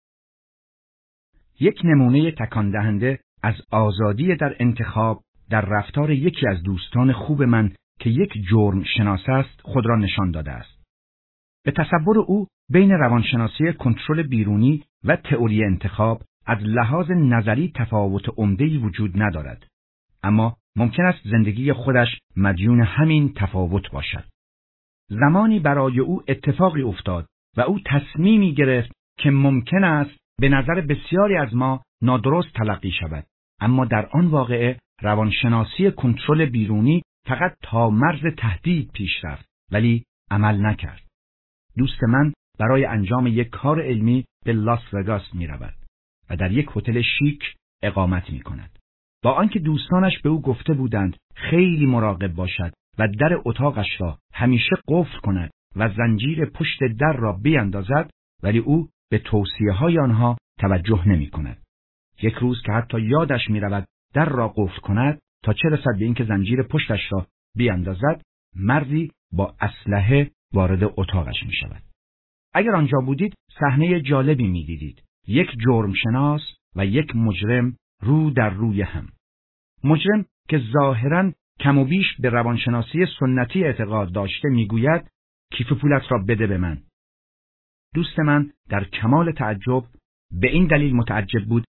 یک نمونه تکان دهنده از آزادی در انتخاب در رفتار یکی از دوستان خوب من که یک جرم شناس است خود را نشان داده است. به تصور او بین روانشناسی کنترل بیرونی و تئوری انتخاب از لحاظ نظری تفاوت عمده‌ای وجود ندارد، اما ممکن است زندگی خودش مدیون همین تفاوت باشد. زمانی برای او اتفاقی افتاد و او تصمیمی گرفت که ممکن است به نظر بسیاری از ما نادرست تلقی شود، اما در آن واقعه روانشناسی کنترل بیرونی فقط تا مرز تهدید پیش رفت ولی عمل نکرد. دوست من برای انجام یک کار علمی به لاس وگاس می رود و در یک هتل شیک اقامت می کند. با آنکه دوستانش به او گفته بودند خیلی مراقب باشد و در اتاقش را همیشه قفل کند و زنجیر پشت در را بیاندازد، ولی او به توصیه های آنها توجه نمی کند. یک روز که حتی یادش می رود در را قفل کند تا چه رسد به اینکه زنجیر پشتش را بیاندازد، مردی با اسلحه وارد اتاقش می شود. اگر آنجا بودید صحنه جالبی می دیدید. یک جرم شناس و یک مجرم رو در روی هم. مجرم که ظاهراً کم و بیش به روانشناسی سنتی اعتقاد داشته میگوید کیف پولت را بده به من. دوست من در کمال تعجب به این دلیل متعجب بود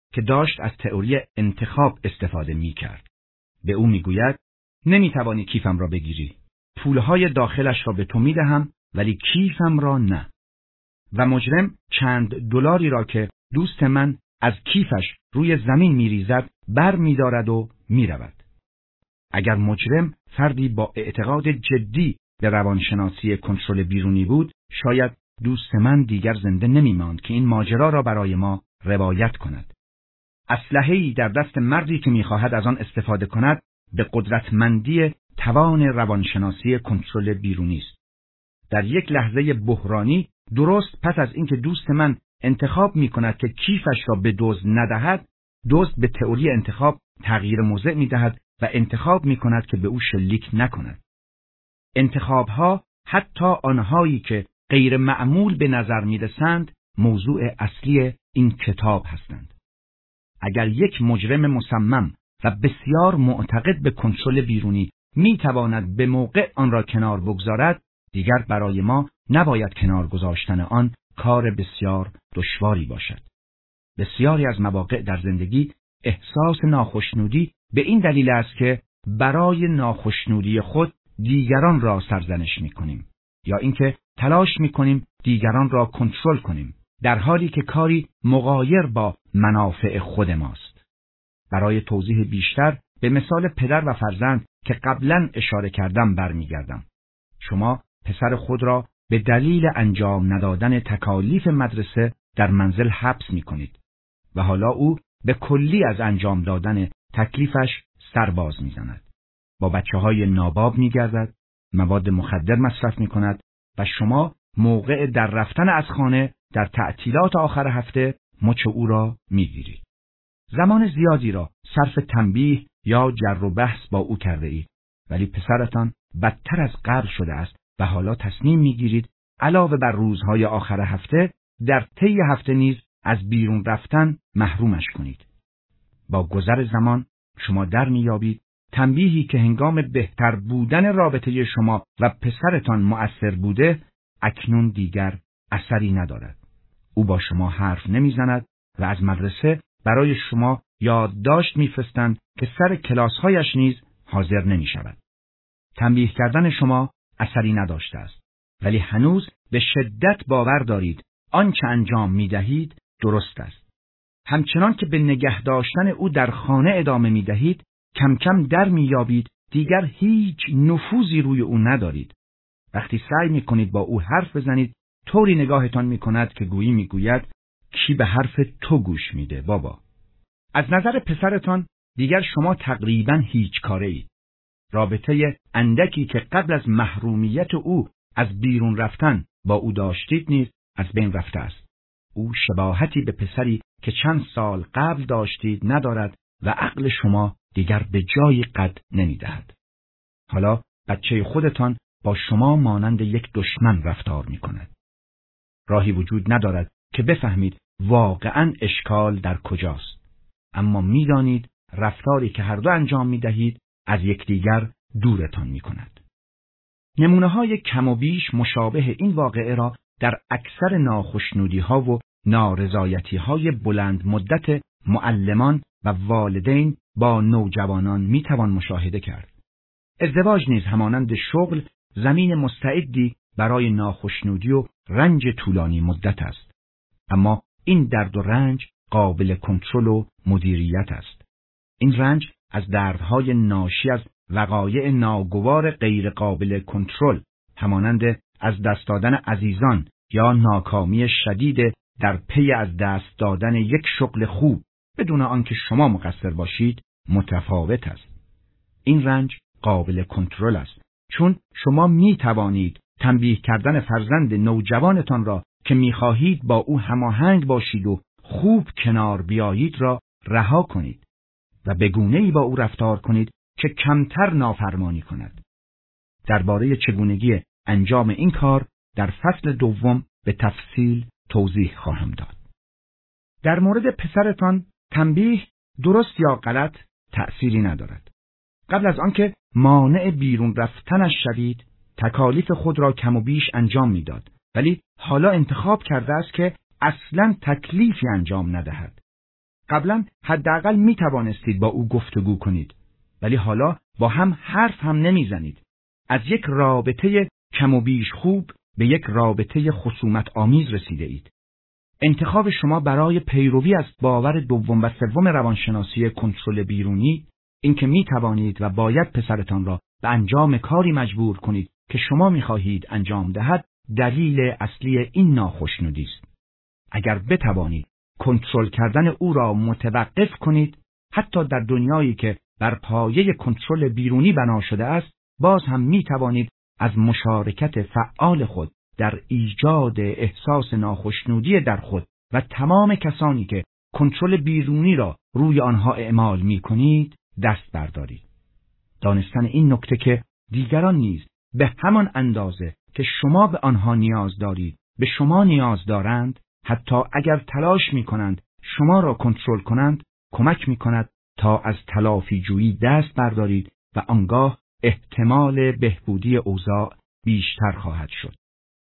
که داشت از تئوری انتخاب استفاده می‌کرد. به او می‌گوید نمی‌توانی کیفم را بگیری. پولهای داخلش را به تو می‌دهم ولی کیفم را نه. و مجرم چند دلاری را که دوست من از کیفش روی زمین می‌ریزد بر می‌دارد و می‌رود. اگر مجرم فردی با اعتقاد جدی به روانشناسی کنترل بیرونی بود، شاید دوست من دیگر زنده نمی‌ماند که این ماجرا را برای ما روایت کند. اسلحه‌ای در دست مردی که می‌خواهد از آن استفاده کند به قدرتمندی توان روانشناسی کنترل بیرونی است. در یک لحظه بحرانی، درست پس از اینکه دوست من انتخاب می‌کند که کیفش را به دزد ندهد، دزد به تئوری انتخاب تغییر موضع می‌دهد و انتخاب می‌کند که به او شلیک نکند. انتخاب‌ها، حتی آنهایی که غیر معمول به نظر می‌رسند، موضوع اصلی این کتاب هستند. اگر یک مجرم مصمم و بسیار معتقد به کنترل بیرونی می‌تواند به موقع آن را کنار بگذارد، دیگر برای ما نباید کنار گذاشتن آن کار بسیار دشواری باشد. بسیاری از مواقع در زندگی احساس ناخشنودی به این دلیل است که برای ناخشنودی خود دیگران را سرزنش می‌کنیم یا اینکه تلاش می‌کنیم دیگران را کنترل کنیم، در حالی که کاری مغایر با منافع خود ماست. برای توضیح بیشتر به مثال پدر و فرزند که قبلا اشاره کردم برمیگردم. شما پسر خود را به دلیل انجام ندادن تکالیف مدرسه در منزل حبس می‌کنید و حالا او به کلی از انجام دادن تکلیفش سرباز می‌زند. با بچه‌های ناباب می‌گردد، مواد مخدر مصرف می‌کند و شما موقع در رفتن از خانه در تعطیلات آخر هفته مچ او را می‌گیرید. زمان زیادی را صرف تنبیه یا جر و بحث با او کرده اید، ولی پسرتان بدتر از قبل شده است و حالا تصمیم می‌گیرید علاوه بر روزهای آخر هفته در طی هفته نیز از بیرون رفتن محرومش کنید. با گذر زمان شما در می‌یابید تنبیهی که هنگام بهتر بودن رابطه شما و پسرتان مؤثر بوده اکنون دیگر اثری ندارد. او با شما حرف نمی‌زند و از مدرسه برای شما یادداشت می‌فرستند که سر کلاس‌هایش نیز حاضر نمی‌شود. تنبیه کردن شما اثری نداشته است، ولی هنوز به شدت باور دارید آنچه انجام می‌دهید درست است. همچنان که به نگه داشتن او در خانه ادامه می‌دهید، کم کم در می‌یابید دیگر هیچ نفوذی روی او ندارید. وقتی سعی می‌کنید با او حرف بزنید، طوری نگاهتان می‌کند که گویی می‌گوید کی به حرف تو گوش میده بابا. از نظر پسرتان دیگر شما تقریباً هیچ کاره اید. رابطه اندکی که قبل از محرومیت او از بیرون رفتن با او داشتید نیز از بین رفته است. او شباهتی به پسری که چند سال قبل داشتید ندارد و عقل شما دیگر به جای قد نمی‌دهد. حالا بچه خودتان با شما مانند یک دشمن رفتار می‌کند. راهی وجود ندارد که بفهمید واقعاً اشکال در کجاست. اما می‌دانید رفتاری که هر دو انجام می‌دهید از یکدیگر دورتان می‌کند. نمونه‌های کم و بیش مشابه این واقعه را در اکثر ناخشنودی‌ها و نارضایتی‌های بلند مدت معلمان و والدین با نوجوانان می‌توان مشاهده کرد. ازدواج نیز همانند شغل زمین مستعدی برای ناخشنودی و رنج طولانی مدت است. اما این درد و رنج قابل کنترل و مدیریت است. این رنج از دردهای ناشی از وقایع ناگوار غیر قابل کنترل، همانند از دست دادن عزیزان یا ناکامی شدید در پی از دست دادن یک شغل خوب بدون آنکه شما مقصر باشید، متفاوت است. این رنج قابل کنترل است، چون شما می توانید تنبیه کردن فرزند نوجوانتان را که می خواهید با او هماهنگ باشید و خوب کنار بیایید را رها کنید و به گونه‌ای با او رفتار کنید که کمتر نافرمانی کند. درباره چگونگی انجام این کار در فصل دوم به تفصیل توضیح خواهم داد. در مورد پسرتان تنبیه درست یا غلط تأثیری ندارد. قبل از آنکه مانع بیرون رفتنش شوید، تکالیف خود را کم و بیش انجام میداد، ولی حالا انتخاب کرده است که اصلاً تکلیفی انجام ندهد. قبلا حداقل می توانستید با او گفتگو کنید، ولی حالا با هم حرف هم نمی زنید. از یک رابطه کم و بیش خوب به یک رابطه خصومت آمیز رسیده اید. انتخاب شما برای پیروی از باور دوم و سوم روانشناسی کنترل بیرونی، اینکه می توانید و باید پسرتان را به انجام کاری مجبور کنید که شما می خواهید انجام دهد، دلیل اصلی این ناخوشنودی است. اگر بتوانید کنترل کردن او را متوقف کنید، حتی در دنیایی که بر پایه کنترل بیرونی بنا شده است، باز هم می توانید از مشارکت فعال خود در ایجاد احساس ناخوشنودی در خود و تمام کسانی که کنترل بیرونی را روی آنها اعمال می کنید دست بردارید. دانستن این نکته که دیگران نیز به همان اندازه که شما به آنها نیاز دارید به شما نیاز دارند، حتی اگر تلاش می کنند شما را کنترل کنند، کمک می کند تا از تلافی جویی دست بردارید و آنگاه احتمال بهبودی اوضاع بیشتر خواهد شد.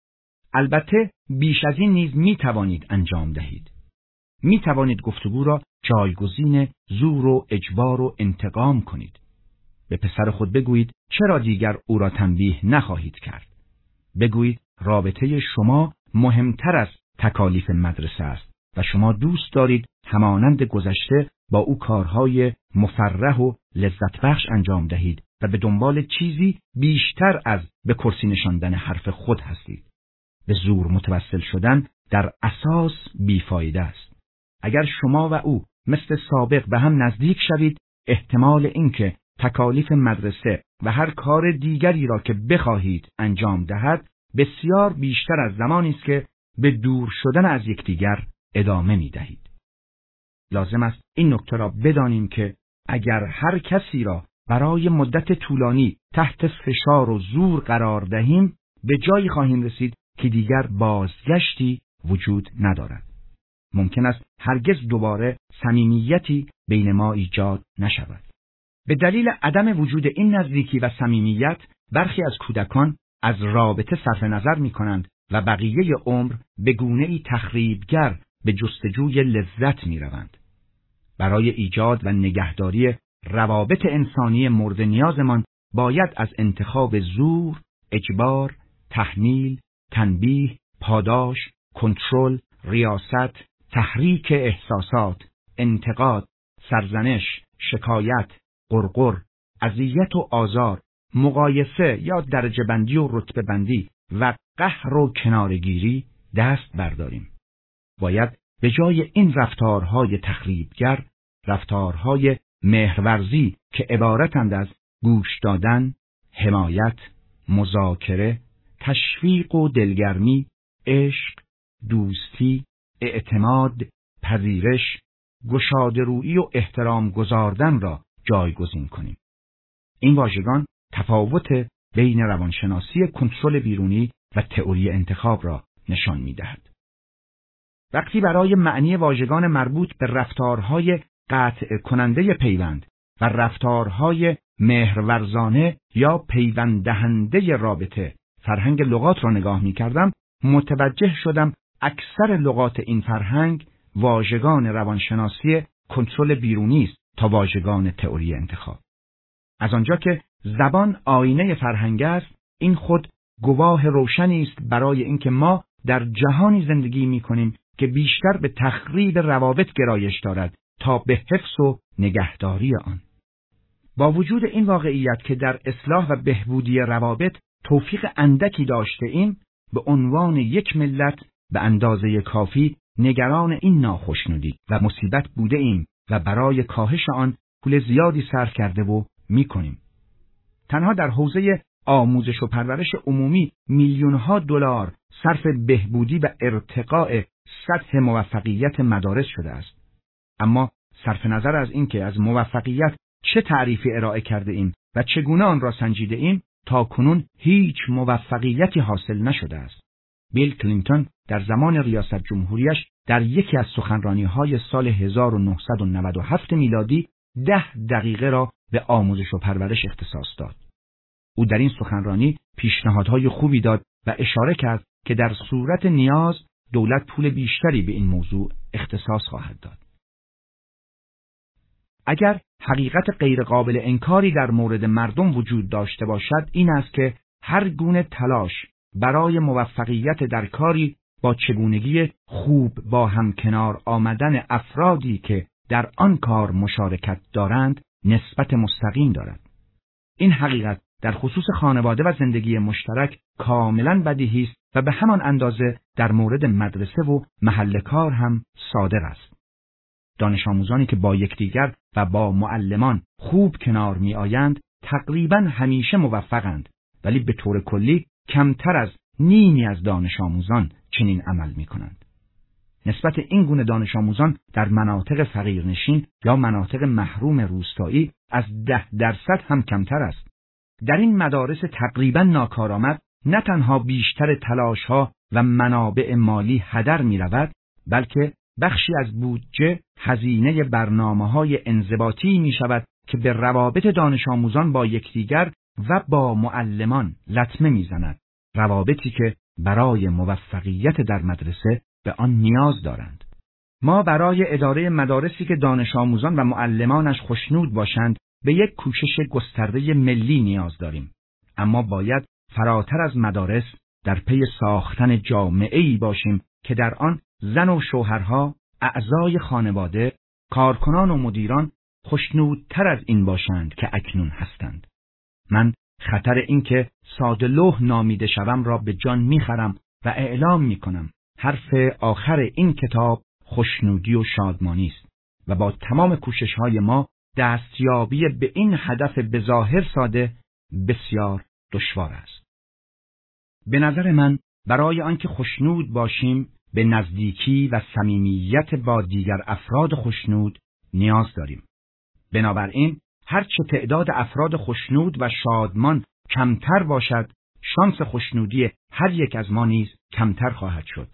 البته بیش از این نیز می توانید انجام دهید. می توانید گفتگو را جایگزین زور و اجبار و انتقام کنید. به پسر خود بگویید چرا دیگر او را تنبیه نخواهید کرد. بگویید رابطه شما مهمتر از تکالیف مدرسه است و شما دوست دارید همانند گذشته با او کارهای مفرح و لذت بخش انجام دهید و به دنبال چیزی بیشتر از به کرسی نشاندن حرف خود هستید. به زور متوسل شدن در اساس بیفایده است. اگر شما و او مثل سابق به هم نزدیک شوید، احتمال اینکه تکالیف مدرسه و هر کار دیگری را که بخواهید انجام دهد بسیار بیشتر از زمانی است که به دور شدن از یکدیگر ادامه می دهید. لازم است این نکته را بدانیم که اگر هر کسی را برای مدت طولانی تحت فشار و زور قرار دهیم، به جایی خواهیم رسید که دیگر بازگشتی وجود ندارد. ممکن است هرگز دوباره صمیمیتی بین ما ایجاد نشود. به دلیل عدم وجود این نزدیکی و صمیمیت، برخی از کودکان از رابطه صرف نظر می کنند و بقیه عمر به گونه‌ای تخریبگر به جستجوی لذت می روند. برای ایجاد و نگهداری روابط انسانی مورد نیازمان باید از انتخاب زور، اجبار، تحمیل، تنبیه، پاداش، کنترل، ریاست، تحریک احساسات، انتقاد، سرزنش، شکایت، غرغر، اذیت و آزار، مقایسه یا درجه بندی و رتبه بندی و قهر و کنارگیری دست برداریم. باید به جای این رفتارهای تخریبگر، رفتارهای مهرورزی که عبارتند از گوش دادن، حمایت، مذاکره، تشویق و دلگرمی، عشق، دوستی، اعتماد، پذیرش، گشاده‌رویی و احترام گذاردن را جایگزین کنیم. این واژگان تفاوت بین روانشناسی کنترل بیرونی و تئوری انتخاب را نشان می‌دهد. وقتی برای معنی واژگان مربوط به رفتارهای قطع کننده پیوند و رفتارهای مهرورزانه یا پیوند دهنده رابطه فرهنگ لغات را نگاه می‌کردم، متوجه شدم اکثر لغات این فرهنگ واژگان روانشناسی کنترل بیرونی است تا واژگان تئوری انتخاب. از آنجا که زبان آینه فرهنگ است، این خود گواه روشنی است برای اینکه ما در جهانی زندگی می‌کنیم که بیشتر به تخریب روابط گرایش دارد تا به حفظ و نگهداری آن. با وجود این واقعیت که در اصلاح و بهبودی روابط توفیق اندکی داشته ایم، به عنوان یک ملت به اندازه کافی نگران این ناخوشنودی و مصیبت بوده ایم و برای کاهش آن پول زیادی صرف کرده و می‌کنیم. تنها در حوزه آموزش و پرورش عمومی میلیون‌ها دلار صرف بهبودی و ارتقاء سطح موفقیت مدارس شده است. اما صرف نظر از اینکه از موفقیت چه تعریفی ارائه کرده ایم و چگونه آن را سنجیده ایم، تا کنون هیچ موفقیتی حاصل نشده است. بیل کلینتون در زمان ریاست جمهوریش در یکی از سخنرانی‌های سال هزار و نهصد و نود و هفت میلادی ده دقیقه را به آموزش و پرورش اختصاص داد. او در این سخنرانی پیشنهادهای خوبی داد و اشاره کرد که در صورت نیاز دولت پول بیشتری به این موضوع اختصاص خواهد داد. اگر حقیقت غیرقابل انکاری در مورد مردم وجود داشته باشد این است که هر گونه تلاش برای موفقیت در کاری با چگونگی خوب با هم کنار آمدن افرادی که در آن کار مشارکت دارند نسبت مستقیم دارد. این حقیقت در خصوص خانواده و زندگی مشترک کاملا بدیهی است و به همان اندازه در مورد مدرسه و محل کار هم صادق است. دانش آموزانی که با یکدیگر و با معلمان خوب کنار می آیند تقریبا همیشه موفقند، ولی به طور کلی کمتر از نیمی از دانش آموزان چنین عمل می کنند. نسبت این گونه دانش آموزان در مناطق فقیرنشین یا مناطق محروم روستایی از ده درصد هم کمتر است. در این مدارس تقریبا ناکارآمد نه تنها بیشتر تلاش‌ها و منابع مالی هدر می رود، بلکه بخشی از بودجه هزینه برنامه‌های انضباطی می شود که به روابط دانش آموزان با یکدیگر و با معلمان لطمه می زند. روابطی که برای موفقیت در مدرسه به آن نیاز دارند. ما برای اداره مدارسی که دانش آموزان و معلمانش خوشنود باشند به یک کوشش گسترده ملی نیاز داریم. اما باید فراتر از مدارس در پی ساختن جامعه‌ای باشیم که در آن زن و شوهرها، اعضای خانواده، کارکنان و مدیران خوشنودتر از این باشند که اکنون هستند. من خطر این که ساده لوح نامیده شوم را به جان میخرم و اعلام میکنم حرف آخر این کتاب خوشنودی و شادمانی است و با تمام کوشش‌های ما دستیابی به این هدف بظاهر ساده بسیار دشوار است. به نظر من برای آنکه خوشنود باشیم به نزدیکی و صمیمیت با دیگر افراد خوشنود نیاز داریم. بنابراین هرچه تعداد افراد خوشنود و شادمان کمتر باشد، شانس خوشنودی هر یک از ما نیز کمتر خواهد شد.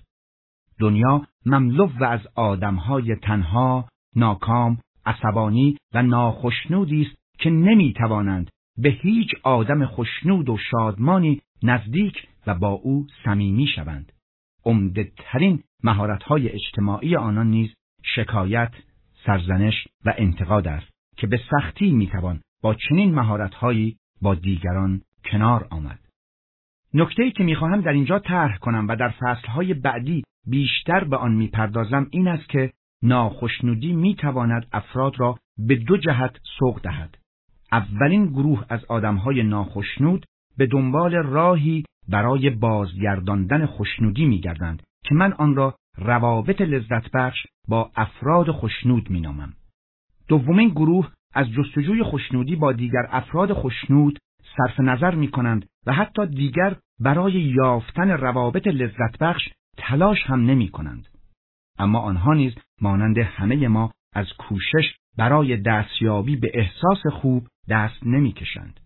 دنیا مملو از آدم‌های تنها، ناکام، عصبانی و ناخوشنودی است که نمی‌توانند به هیچ آدم خوشنود و شادمانی نزدیک و با او صمیمی شوند. عمده‌ترین مهارت‌های اجتماعی آنان نیز شکایت، سرزنش و انتقاد است که به سختی می‌توان با چنین مهارت‌هایی با دیگران کنار آمد. نکته‌ای که می‌خواهم در اینجا طرح کنم و در فصل‌های بعدی بیشتر به آن می‌پردازم این است که ناخوشنودی می‌تواند افراد را به دو جهت سوق دهد. اولین گروه از آدم‌های ناخوشنود به دنبال راهی برای بازگرداندن خوشنودی می‌گردند که من آن را روابط لذت بخش با افراد خوشنود می‌نامم. دومین گروه از جستجوی خوشنودی با دیگر افراد خوشنود صرف نظر می‌کنند و حتی دیگر برای یافتن روابط لذت بخش تلاش هم نمی‌کنند. اما آنها نیز مانند همه ما از کوشش برای دستیابی به احساس خوب دست نمی‌کشند.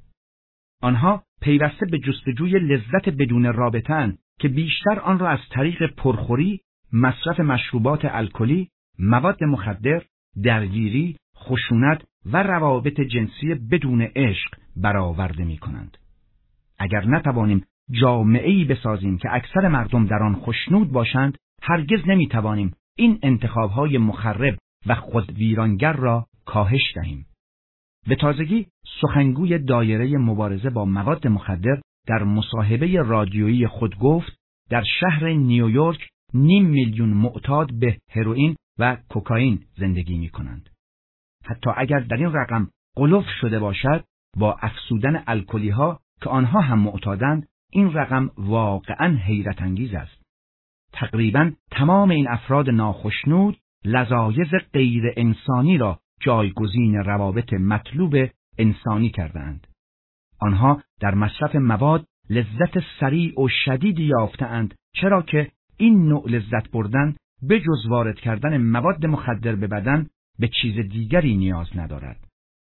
آنها پیوسته به جستجوی لذت بدون رابطه‌اند که بیشتر آن را از طریق پرخوری، مصرف مشروبات الکلی، مواد مخدر، درگیری، خشونت و روابط جنسی بدون عشق برآورده می‌کنند. اگر نتوانیم جامعه‌ای بسازیم که اکثر مردم در آن خوشنود باشند، هرگز نمی‌توانیم این انتخاب‌های مخرب و خودویرانگر را کاهش دهیم. به تازگی سخنگوی دایره مبارزه با مواد مخدر در مصاحبه رادیویی خود گفت در شهر نیویورک نیم میلیون معتاد به هروئین و کوکائین زندگی می‌کنند. حتی اگر در این رقم غلو شده باشد، با افزودن الکلی‌ها که آنها هم معتادند، این رقم واقعاً حیرت انگیز است. تقریباً تمام این افراد ناخوشنود لذایذ غیر انسانی را جایگزین روابط مطلوب انسانی کردند. آنها در مصرف مواد لذت سریع و شدیدی یافته‌اند، چرا که این نوع لذت بردن به جز وارد کردن مواد مخدر به بدن به چیز دیگری نیاز ندارد.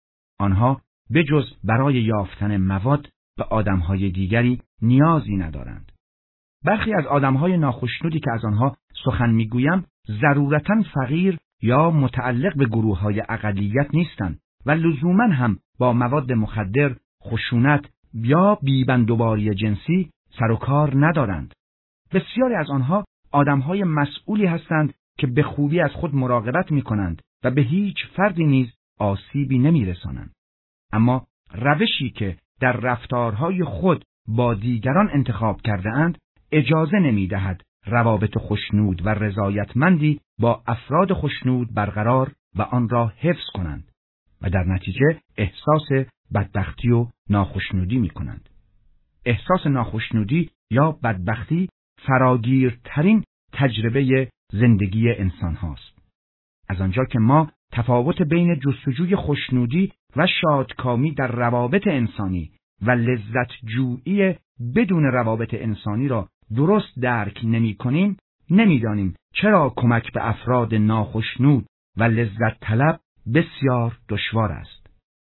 آنها به جز برای یافتن مواد به آدم‌های دیگری نیازی ندارند. برخی از آدم‌های ناخوشنودی که از آنها سخن می‌گویم ضرورتاً فقیر یا متعلق به گروه‌های اقلیت نیستند و لزوماً هم با مواد مخدر، خشونت یا بیبندوباری جنسی سر و کار ندارند. بسیاری از آنها آدم‌های مسئولی هستند که به خوبی از خود مراقبت می‌کنند و به هیچ فردی نیز آسیبی نمی‌رسانند. اما روشی که در رفتارهای خود با دیگران انتخاب کرده اند اجازه نمی‌دهد روابط خوشنود و رضایتمندی با افراد خوشنود برقرار و آن را حفظ کنند و در نتیجه احساس بدبختی و ناخوشنودی می‌کنند. احساس ناخوشنودی یا بدبختی فراگیرترین تجربه زندگی انسان هاست. از آنجا که ما تفاوت بین جستجوی خوشنودی و شادکامی در روابط انسانی و لذت جویی بدون روابط انسانی را درست درک نمی کنیم، نمی دانیم چرا کمک به افراد ناخوشنود و لذت طلب بسیار دشوار است.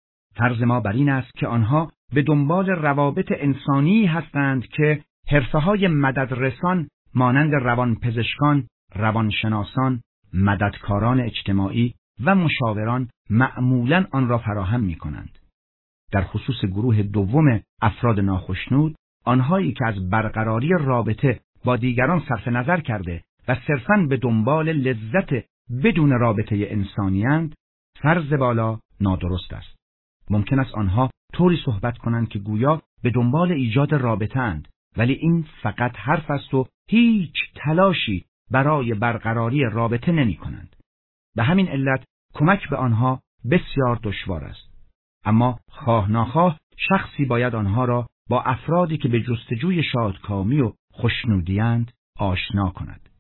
فرض ما بر این است که آنها به دنبال روابط انسانی هستند که حرفه‌های مددرسان مانند روانپزشکان، روانشناسان، مددکاران اجتماعی و مشاوران معمولاً آن را فراهم می‌کنند. در خصوص گروه دوم افراد ناخوشنود، آنهایی که از برقراری رابطه با دیگران صرف نظر کرده و صرفاً به دنبال لذت بدون رابطه انسانی‌اند، فرض بالا نادرست است. ممکن است آنها طوری صحبت کنند که گویا به دنبال ایجاد رابطه اند، ولی این فقط حرف است و هیچ تلاشی برای برقراری رابطه نمی کنند. به همین علت کمک به آنها بسیار دشوار است. اما خواه ناخواه شخصی باید آنها را با افرادی که به جستجوی شادکامی و خوشنودی‌اند آشنا کند.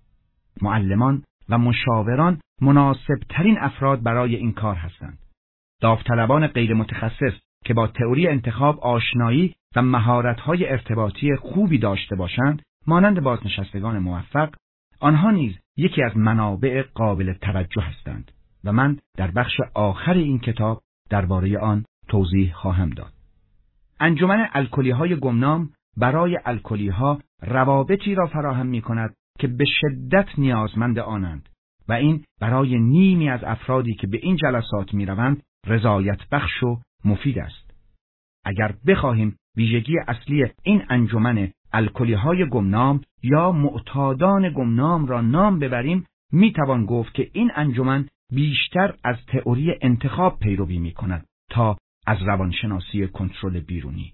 معلمان و مشاوران مناسب ترین افراد برای این کار هستند. داوطلبان غیر متخصص که با تئوری انتخاب آشنایی و مهارت‌های ارتباطی خوبی داشته باشند، مانند بازنشستگان موفق، آنها نیز یکی از منابع قابل توجه هستند و من در بخش آخر این کتاب درباره آن توضیح خواهم داد. انجمن الکلی‌های گمنام برای الکلی‌ها روابطی را فراهم می‌کند که به شدت نیازمند آنند و این برای نیمی از افرادی که به این جلسات می‌روند رضایت بخش و مفید است. اگر بخواهیم ویژگی اصلی این انجمن الکلی‌های گمنام یا معتادان گمنام را نام ببریم، میتوان گفت که این انجمن بیشتر از تئوری انتخاب پیروی میکند تا از روانشناسی کنترل بیرونی.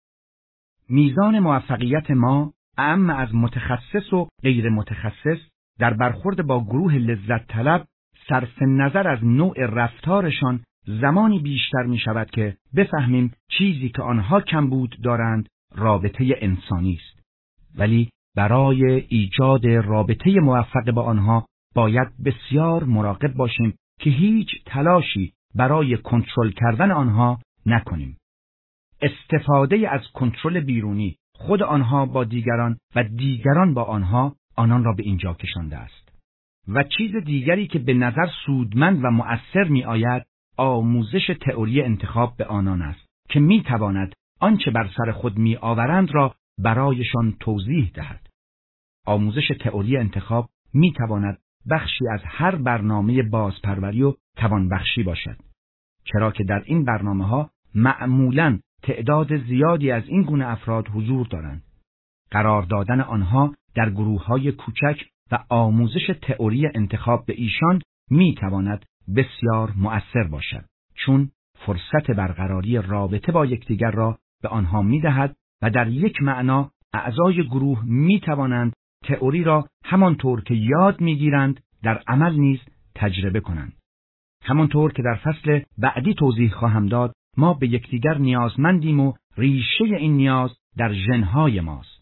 میزان موفقیت ما اعم از متخصص و غیر متخصص در برخورد با گروه لذت طلب صرف نظر از نوع رفتارشان زمانی بیشتر می شود که بفهمیم چیزی که آنها کمبود دارند رابطه انسانی است. ولی برای ایجاد رابطه موفق با آنها باید بسیار مراقب باشیم که هیچ تلاشی برای کنترل کردن آنها نکنیم. استفاده از کنترل بیرونی خود آنها با دیگران و دیگران با آنها آنان را به اینجا کشانده است. و چیز دیگری که به نظر سودمند و مؤثر می آید آموزش تئوری انتخاب به آنان است که می تواند آنچه بر سر خود می آورند را برایشان توضیح دهد. آموزش تئوری انتخاب می تواند بخشی از هر برنامه بازپروری و توانبخشی باشد، چرا که در این برنامه ها معمولاً تعداد زیادی از این گونه افراد حضور دارند. قرار دادن آنها در گروه‌های کوچک و آموزش تئوری انتخاب به ایشان می تواند بسیار مؤثر باشد، چون فرصت برقراری رابطه با یکدیگر را به آنها می دهد و در یک معنا اعضای گروه می توانند تئوری را همانطور که یاد می گیرند در عمل نیز تجربه کنند. همانطور که در فصل بعدی توضیح خواهم داد، ما به یکدیگر نیازمندیم و ریشه این نیاز در ژن‌های ماست.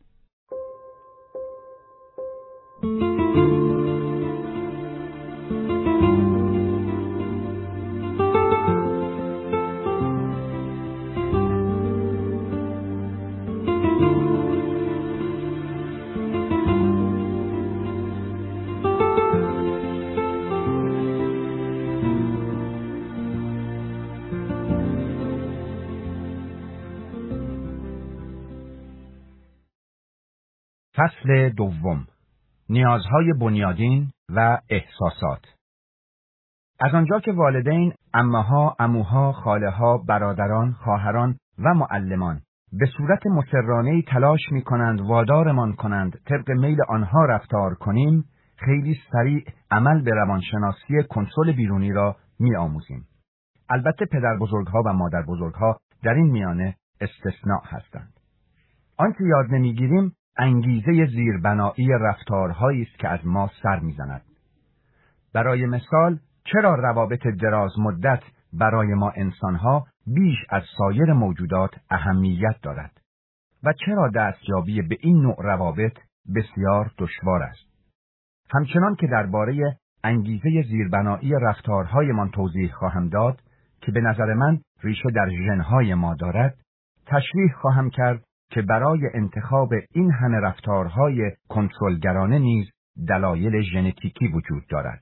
فصل دوم، نیازهای بنیادین و احساسات. از آنجا که والدین، عمه‌ها، عموها، خاله‌ها، برادران، خواهران و معلمان به صورت مسررانه‌ای تلاش می‌کنند وادارمان کنند طبق میل آنها رفتار کنیم، خیلی سریع عمل به روانشناسی کنترل بیرونی را می‌آموزیم. البته پدر بزرگها و مادر بزرگها در این میانه استثناء هستند. آنچه یاد نمیگیریم انگیزه زیربنایی رفتارهایی است که از ما سر میزند. برای مثال، چرا روابط دراز مدت برای ما انسانها بیش از سایر موجودات اهمیت دارد و چرا دستیابی به این نوع روابط بسیار دشوار است؟ همچنان که درباره انگیزه زیربنایی رفتارهایمان توضیح خواهم داد که به نظر من ریشه در ژن‌های ما دارد، تشریح خواهم کرد که برای انتخاب این همه رفتارهای کنترلگرانه نیز دلایل ژنتیکی وجود دارد.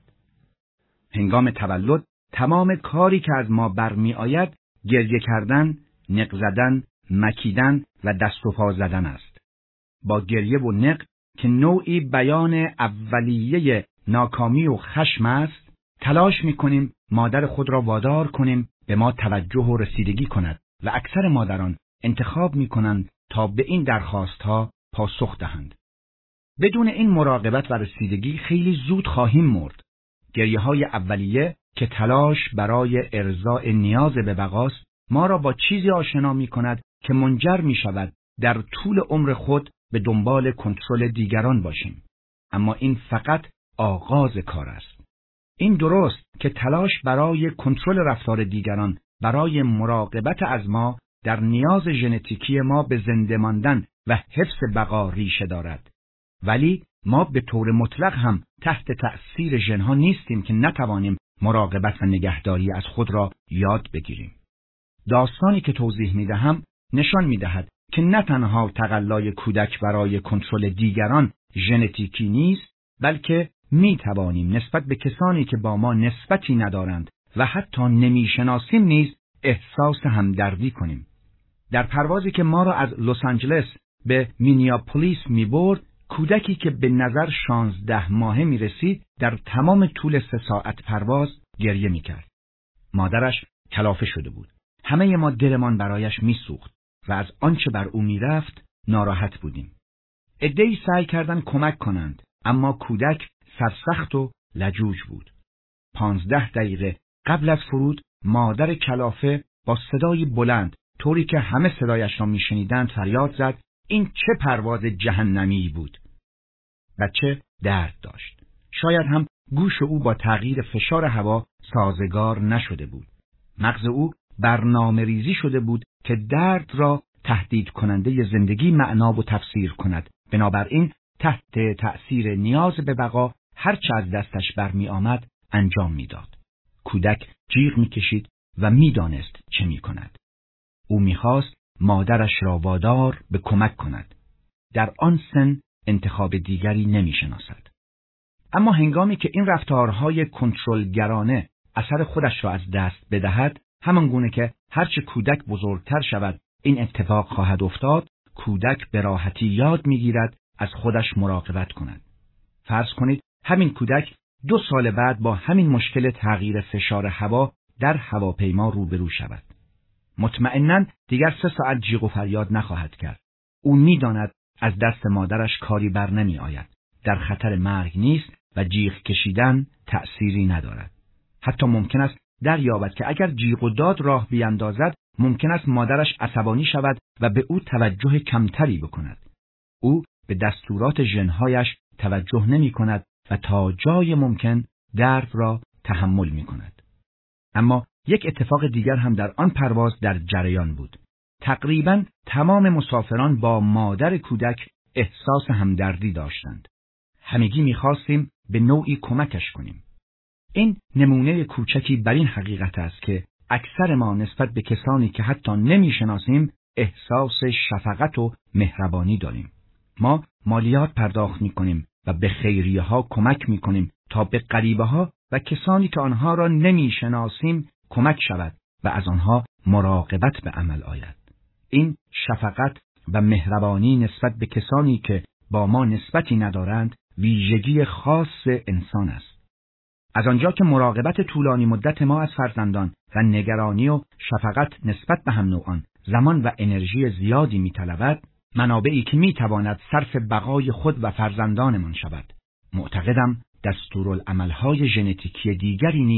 هنگام تولد تمام کاری که از ما برمی آید گریه کردن، نق زدن، مکیدن و دست و پا زدن است. با گریه و نق که نوعی بیان اولیه ناکامی و خشم است، تلاش می کنیم مادر خود را وادار کنیم به ما توجه و رسیدگی کند و اکثر مادران انتخاب می کنند تا به این درخواست ها پاسخ دهند. بدون این مراقبت و رسیدگی خیلی زود خواهیم مرد. گریه های اولیه که تلاش برای ارضاء نیاز به بقاست ما را با چیزی آشنا می کند که منجر می شود در طول عمر خود به دنبال کنترل دیگران باشیم. اما این فقط آغاز کار است. این درست که تلاش برای کنترل رفتار دیگران برای مراقبت از ما در نیاز ژنتیکی ما به زنده ماندن و حفظ بقا ریشه دارد. ولی ما به طور مطلق هم تحت تأثیر ژن‌ها نیستیم که نتوانیم مراقبت و نگهداری از خود را یاد بگیریم. داستانی که توضیح می‌دهم نشان می‌دهد که نه تنها تقلای کودک برای کنترل دیگران ژنتیکی نیست، بلکه می‌توانیم نسبت به کسانی که با ما نسبتی ندارند و حتی نمی‌شناسیم نیز احساس همدردی کنیم. در پروازی که ما را از لس آنجلس به مینیاپولیس می‌برد، کودکی که به نظر شانزده ماهه می رسید در تمام طول سه ساعت پرواز گریه می کرد. مادرش کلافه شده بود. همه ما دلمان برایش می سوخت و از آنچه بر او می رفت ناراحت بودیم. عده‌ای سعی کردند کمک کنند، اما کودک سرسخت و لجوج بود. پانزده دقیقه قبل از فرود مادر کلافه با صدای بلند، طوری که همه صدایش را می شنیدند، فریاد زد: این چه پرواز جهنمی بود؟ بچه درد داشت. شاید هم گوش او با تغییر فشار هوا سازگار نشده بود. مغز او برنامه ریزی شده بود که درد را تهدید کننده زندگی معنا و تفسیر کند. بنابراین تحت تأثیر نیاز به بقا هر چه از دستش برمی آمد انجام میداد. کودک جیغ میکشید و میدانست چه میکند. او میخواست مادرش را وادار به کمک کند. در آن سن انتخاب دیگری نمیشناسد. اما هنگامی که این رفتارهای کنترلگرانه اثر خودش را از دست بدهد، همان گونه که هرچه کودک بزرگتر شود این اتفاق خواهد افتاد، کودک به راحتی یاد میگیرد از خودش مراقبت کند. فرض کنید همین کودک دو سال بعد با همین مشکل تغییر فشار هوا در هواپیما روبرو شود. مطمئناً دیگر سه ساعت جیغ و فریاد نخواهد کرد. او می‌داند از دست مادرش کاری بر نمی آید. در خطر مرگ نیست و جیغ کشیدن تأثیری ندارد. حتی ممکن است دریابد که اگر جیغ و داد راه بیندازد، ممکن است مادرش عصبانی شود و به او توجه کمتری بکند. او به دستورات ژن‌هایش توجه نمی کند و تا جای ممکن درد را تحمل می کند. اما یک اتفاق دیگر هم در آن پرواز در جریان بود. تقریباً تمام مسافران با مادر کودک احساس همدردی داشتند. همگی می‌خواستیم به نوعی کمکش کنیم. این نمونه کوچکی بر این حقیقت است که اکثر ما نسبت به کسانی که حتی نمی‌شناسیم احساس شفقت و مهربانی داریم. ما مالیات پرداخت می‌کنیم و به خیریه‌ها کمک می‌کنیم تا به غریبه‌ها و کسانی که آنها را نمی‌شناسیم کمک شود و از آنها مراقبت به عمل آید. این شفقت و مهربانی نسبت به کسانی که با ما نسبتی ندارند ویژگی خاص انسان است. از آنجا که مراقبت طولانی مدت ما از فرزندان و نگرانی و شفقت نسبت به هم نوعان زمان و انرژی زیادی می‌طلبد، منابعی که می‌تواند صرف بقای خود و فرزندانمان شود. معتقدم دستورالعمل‌های ژنتیکی دیگری نیز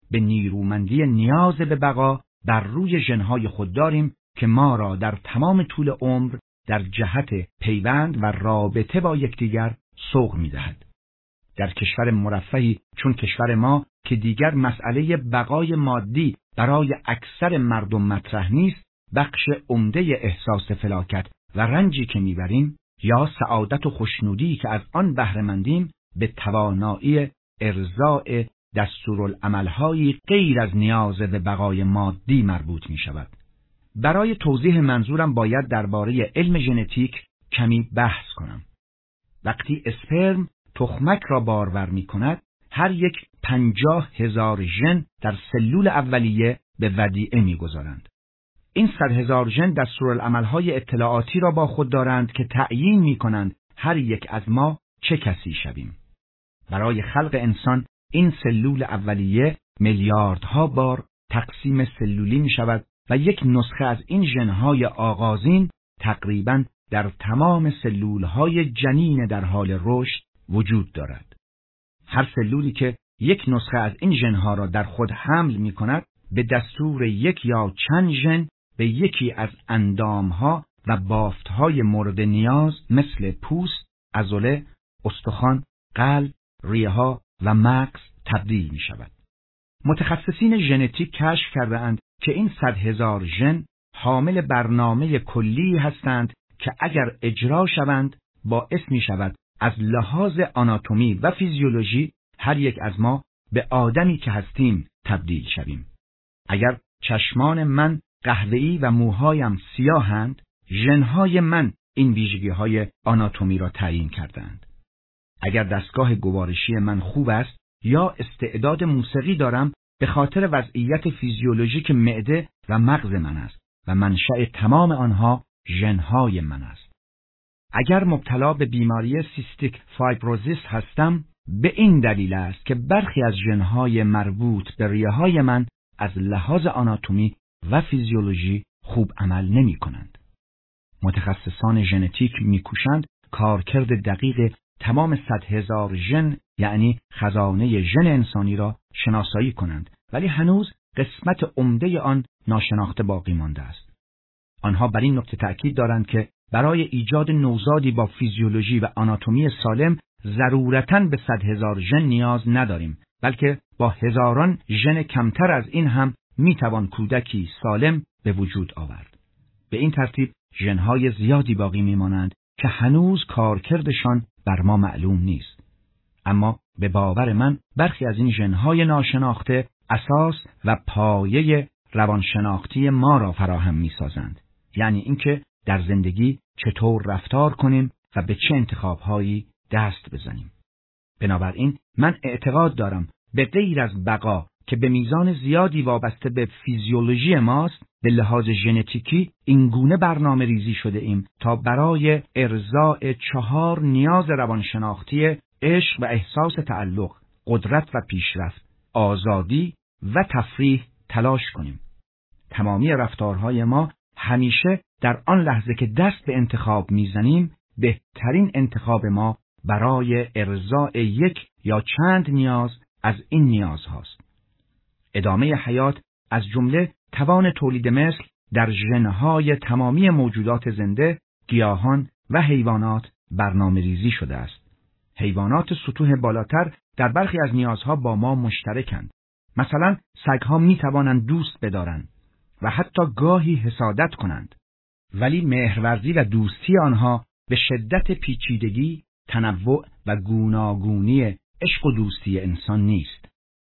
به نیرومندی نیاز به بقا بر روی ژن‌های خود داریم که ما را در تمام طول عمر در جهت پیوند و رابطه با یکدیگر سوق می‌دهد. در کشور مرفهی چون کشور ما که دیگر مسئله بقای مادی برای اکثر مردم مطرح نیست، بخش عمده احساس فلاکت و رنجی که می‌بریم یا سعادت و خوشنودی که از آن بهره‌مندیم به توانایی ارضاء دستورالعمل‌هایی غیر از نیاز به بقای مادی مربوط می‌شود. برای توضیح منظورم باید درباره علم ژنتیک کمی بحث کنم. وقتی اسپرم تخمک را بارور می‌کند، هر یک پنجاه هزار ژن در سلول اولیه به ودیعه می‌گذارند. این صد هزار ژن دستورالعمل‌های اطلاعاتی را با خود دارند که تعیین می‌کنند هر یک از ما چه کسی شویم. برای خلق انسان این سلول اولیه میلیاردها بار تقسیم سلولی می‌شود و یک نسخه از این ژن‌های آغازین تقریباً در تمام سلول‌های جنین در حال رشد وجود دارد. هر سلولی که یک نسخه از این ژن‌ها را در خود حمل می‌کند، به دستور یک یا چند ژن به یکی از اندام‌ها و بافت‌های مورد نیاز مثل پوست، عضله، استخوان، قلب، ریه‌ها و مغز تبدیل می‌شود. متخصصین ژنتیک کشف کرده‌اند که این صد هزار ژن حامل برنامه کلی هستند که اگر اجرا شوند باعث می‌شود از لحاظ آناتومی و فیزیولوژی هر یک از ما به آدمی که هستیم تبدیل شویم. اگر چشمان من قهوه‌ای و موهایم سیاهند، ژن‌های من این ویژگی‌های آناتومی را تعیین کردند. اگر دستگاه گوارشی من خوب است یا استعداد موسیقی دارم، به خاطر وضعیت فیزیولوژیک معده و مغز من است و منشأ تمام آنها ژن‌های من است. اگر مبتلا به بیماری سیستیک فایبروزیس هستم، به این دلیل است که برخی از ژن‌های مربوط به ریه‌های من از لحاظ آناتومی و فیزیولوژی خوب عمل نمی‌کنند. متخصصان ژنتیک می‌کوشند کارکرد دقیق تمام صد هزار ژن یعنی خزانه ژن انسانی را شناسایی کنند، ولی هنوز قسمت عمده آن ناشناخته باقی مانده است. آنها بر این نکته تأکید دارند که برای ایجاد نوزادی با فیزیولوژی و آناتومی سالم ضرورتاً به صد هزار ژن نیاز نداریم، بلکه با هزاران ژن کمتر از این هم میتوان کودکی سالم به وجود آورد. به این ترتیب ژن‌های زیادی باقی میمانند که هنوز کارکردشان بر ما معلوم نیست. اما به باور من برخی از این ژن‌های ناشناخته اساس و پایه روانشناختی ما را فراهم می‌سازند. یعنی اینکه در زندگی چطور رفتار کنیم و به چه انتخاب‌هایی دست بزنیم. بنابراین من اعتقاد دارم به غیر از بقا که به میزان زیادی وابسته به فیزیولوژی ماست، به لحاظ ژنتیکی اینگونه برنامه ریزی شده ایم تا برای ارضاء چهار نیاز روانشناختی عشق و احساس تعلق، قدرت و پیشرفت، آزادی و تفریح تلاش کنیم. تمامی رفتارهای ما همیشه در آن لحظه که دست به انتخاب میزنیم، بهترین انتخاب ما برای ارضاء یک یا چند نیاز از این نیاز هاست. ادامه حیات از جمله توان تولید مثل در ژن‌های تمامی موجودات زنده، گیاهان و حیوانات برنامه ریزی شده است. حیوانات سطوح بالاتر در برخی از نیازها با ما مشترکند. مثلا سگ‌ها می توانند دوست بدارند و حتی گاهی حسادت کنند، ولی مهرورزی و دوستی آنها به شدت پیچیدگی، تنوع و گوناگونی عشق و دوستی انسان نیست.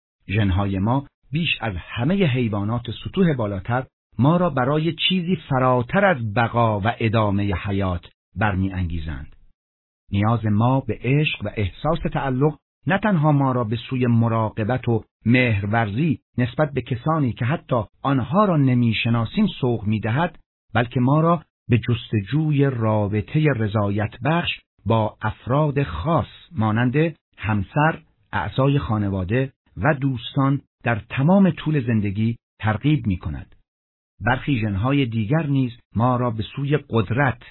ژن‌های ما بیش از همه حیوانات سطوح بالاتر ما را برای چیزی فراتر از بقا و ادامه حیات برمی انگیزند. نیاز ما به عشق و احساس تعلق نه تنها ما را به سوی مراقبت و مهرورزی نسبت به کسانی که حتی آنها را نمیشناسیم سوق می‌دهد، بلکه ما را به جستجوی رابطه رضایت بخش با افراد خاص مانند همسر، اعضای خانواده و دوستان در تمام طول زندگی ترغیب می‌کند. برخی ژن‌های دیگر نیز ما را به سوی قدرت،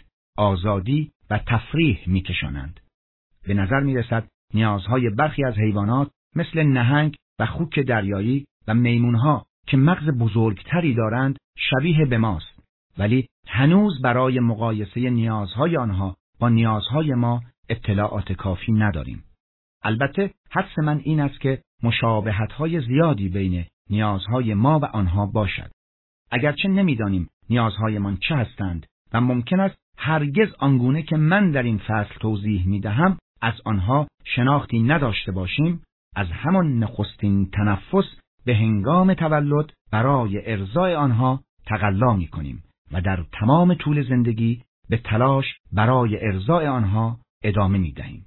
آزادی و تفریح می‌کشانند. به نظر می‌رسد نیازهای برخی از حیوانات مثل نهنگ و خوک دریایی و میمونها که مغز بزرگتری دارند شبیه به ماست، ولی هنوز برای مقایسه نیازهای آنها با نیازهای ما اطلاعات کافی نداریم. البته حدس من این است که مشابهت‌های زیادی بین نیازهای ما و آنها باشد. اگرچه نمی‌دانیم نیازهایمان چه هستند و ممکن است هرگز آنگونه که من در این فصل توضیح می‌دهم از آنها شناختی نداشته باشیم، از همان نخستین تنفس به هنگام تولد برای ارضای آنها تقلا می‌کنیم و در تمام طول زندگی به تلاش برای ارضای آنها ادامه می‌دهیم.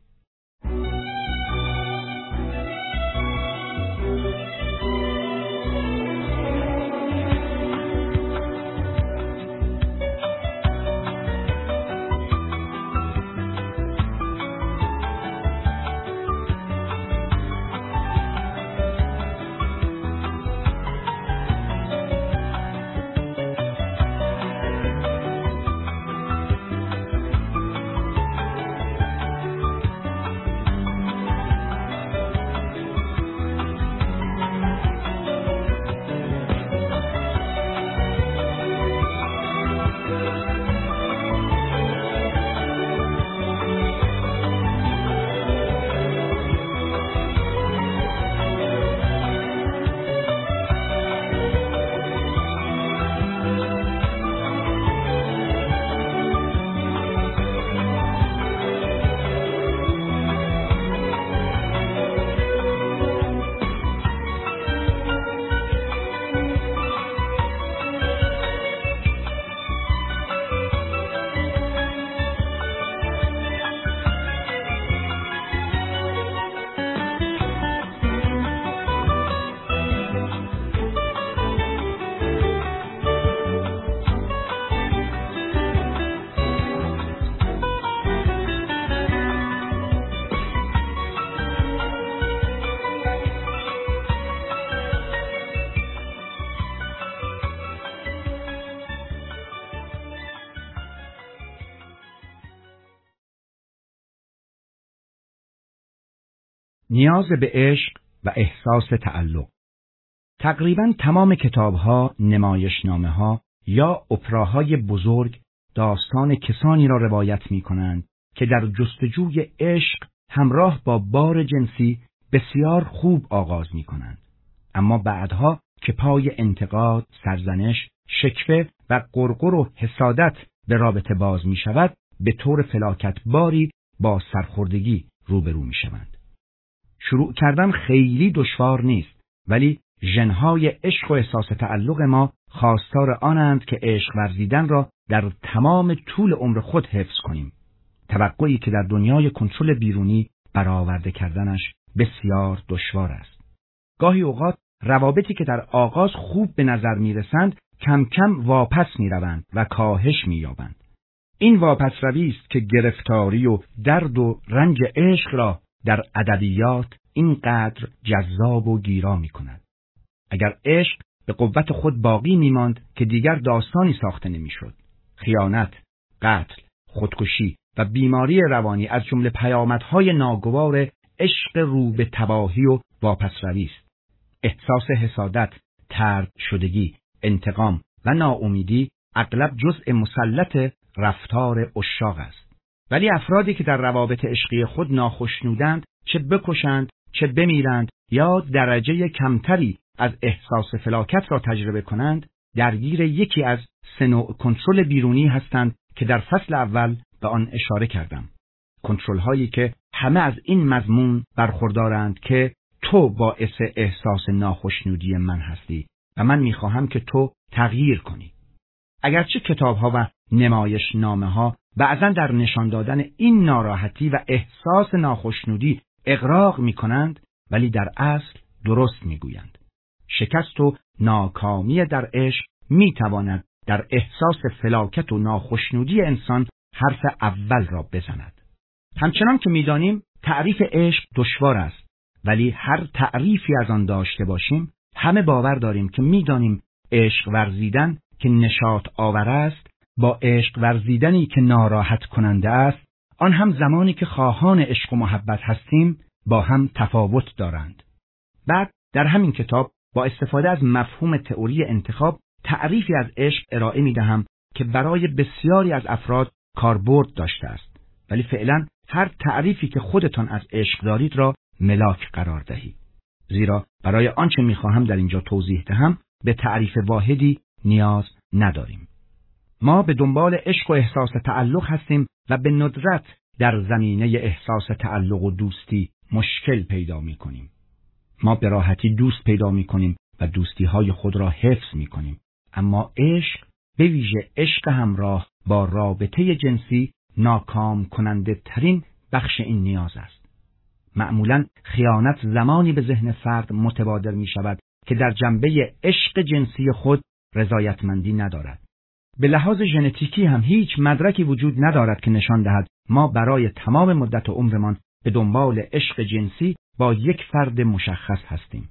نیاز به عشق و احساس تعلق. تقریباً تمام کتاب‌ها، نمایشنامه‌ها یا اپراهای بزرگ داستان کسانی را روایت می‌کنند که در جستجوی عشق همراه با بار جنسی بسیار خوب آغاز می‌کنند، اما بعدها که پای انتقاد، سرزنش، شکوه و غرغر و حسادت به رابطه باز می‌شود، به طور فلاکتباری با سرخوردگی روبرو می‌شوند. شروع کردن خیلی دشوار نیست، ولی ژن‌های عشق و احساس تعلق ما خواستار آنند که عشق ورزیدن را در تمام طول عمر خود حفظ کنیم. توقعی که در دنیای کنترل بیرونی برآورده کردنش بسیار دشوار است. گاهی اوقات روابطی که در آغاز خوب به نظر می‌رسند کم کم واپس می‌روند و کاهش می‌یابند. این واپس روی است که گرفتاری و درد و رنج عشق را در ادبیات اینقدر جذاب و گیرا می‌کند. اگر عشق به قوت خود باقی می‌ماند که دیگر داستانی ساخته نمی‌شد. خیانت، قتل، خودکشی و بیماری روانی از جمله پیامدهای ناگوار عشق رو به تباهی و واپس روی است. احساس حسادت، طرد شدگی، انتقام و ناامیدی اغلب جزء مسلط رفتار عشاق است. ولی افرادی که در روابط عشقی خود ناخشنودند، چه بکشند، چه بمیرند یا درجه کمتری از احساس فلاکت را تجربه کنند، درگیر یکی از سه نوع کنترل بیرونی هستند که در فصل اول به آن اشاره کردم. کنترل هایی که همه از این مضمون برخوردارند که تو باعث احساس ناخشنودی من هستی و من میخواهم که تو تغییر کنی. اگرچه کتاب ها و نمایش نامه ها بعضا در نشان دادن این ناراحتی و احساس ناخشنودی اغراق می کنند، ولی در اصل درست می گویند. شکست و ناکامی در عشق می تواند در احساس فلاکت و ناخشنودی انسان حرف اول را بزند. همچنان که می دانیم تعریف عشق دشوار است، ولی هر تعریفی از آن داشته باشیم، همه باور داریم که می دانیم عشق ورزیدن که نشاط آور است با عشق ورزیدنی که ناراحت کننده است، آن هم زمانی که خواهان عشق و محبت هستیم، با هم تفاوت دارند. بعد در همین کتاب با استفاده از مفهوم تئوری انتخاب تعریفی از عشق ارائه می‌دهم که برای بسیاری از افراد کاربرد داشته است، ولی فعلا هر تعریفی که خودتان از عشق دارید را ملاک قرار دهید، زیرا برای آنچه می‌خواهم در اینجا توضیح دهم به تعریف واحدی نیاز نداریم. ما به دنبال عشق و احساس تعلق هستیم و به ندرت در زمینه احساس تعلق و دوستی مشکل پیدا می‌کنیم. ما به راحتی دوست پیدا می‌کنیم و دوستی‌های خود را حفظ می‌کنیم، اما عشق، به ویژه عشق همراه با رابطه جنسی، ناکام کننده ترین بخش این نیاز است. معمولاً خیانت زمانی به ذهن فرد متبادر می‌شود که در جنبه عشق جنسی خود رضایتمندی ندارد. به لحاظ ژنتیکی هم هیچ مدرکی وجود ندارد که نشان دهد ما برای تمام مدت عمرمان به دنبال عشق جنسی با یک فرد مشخص هستیم.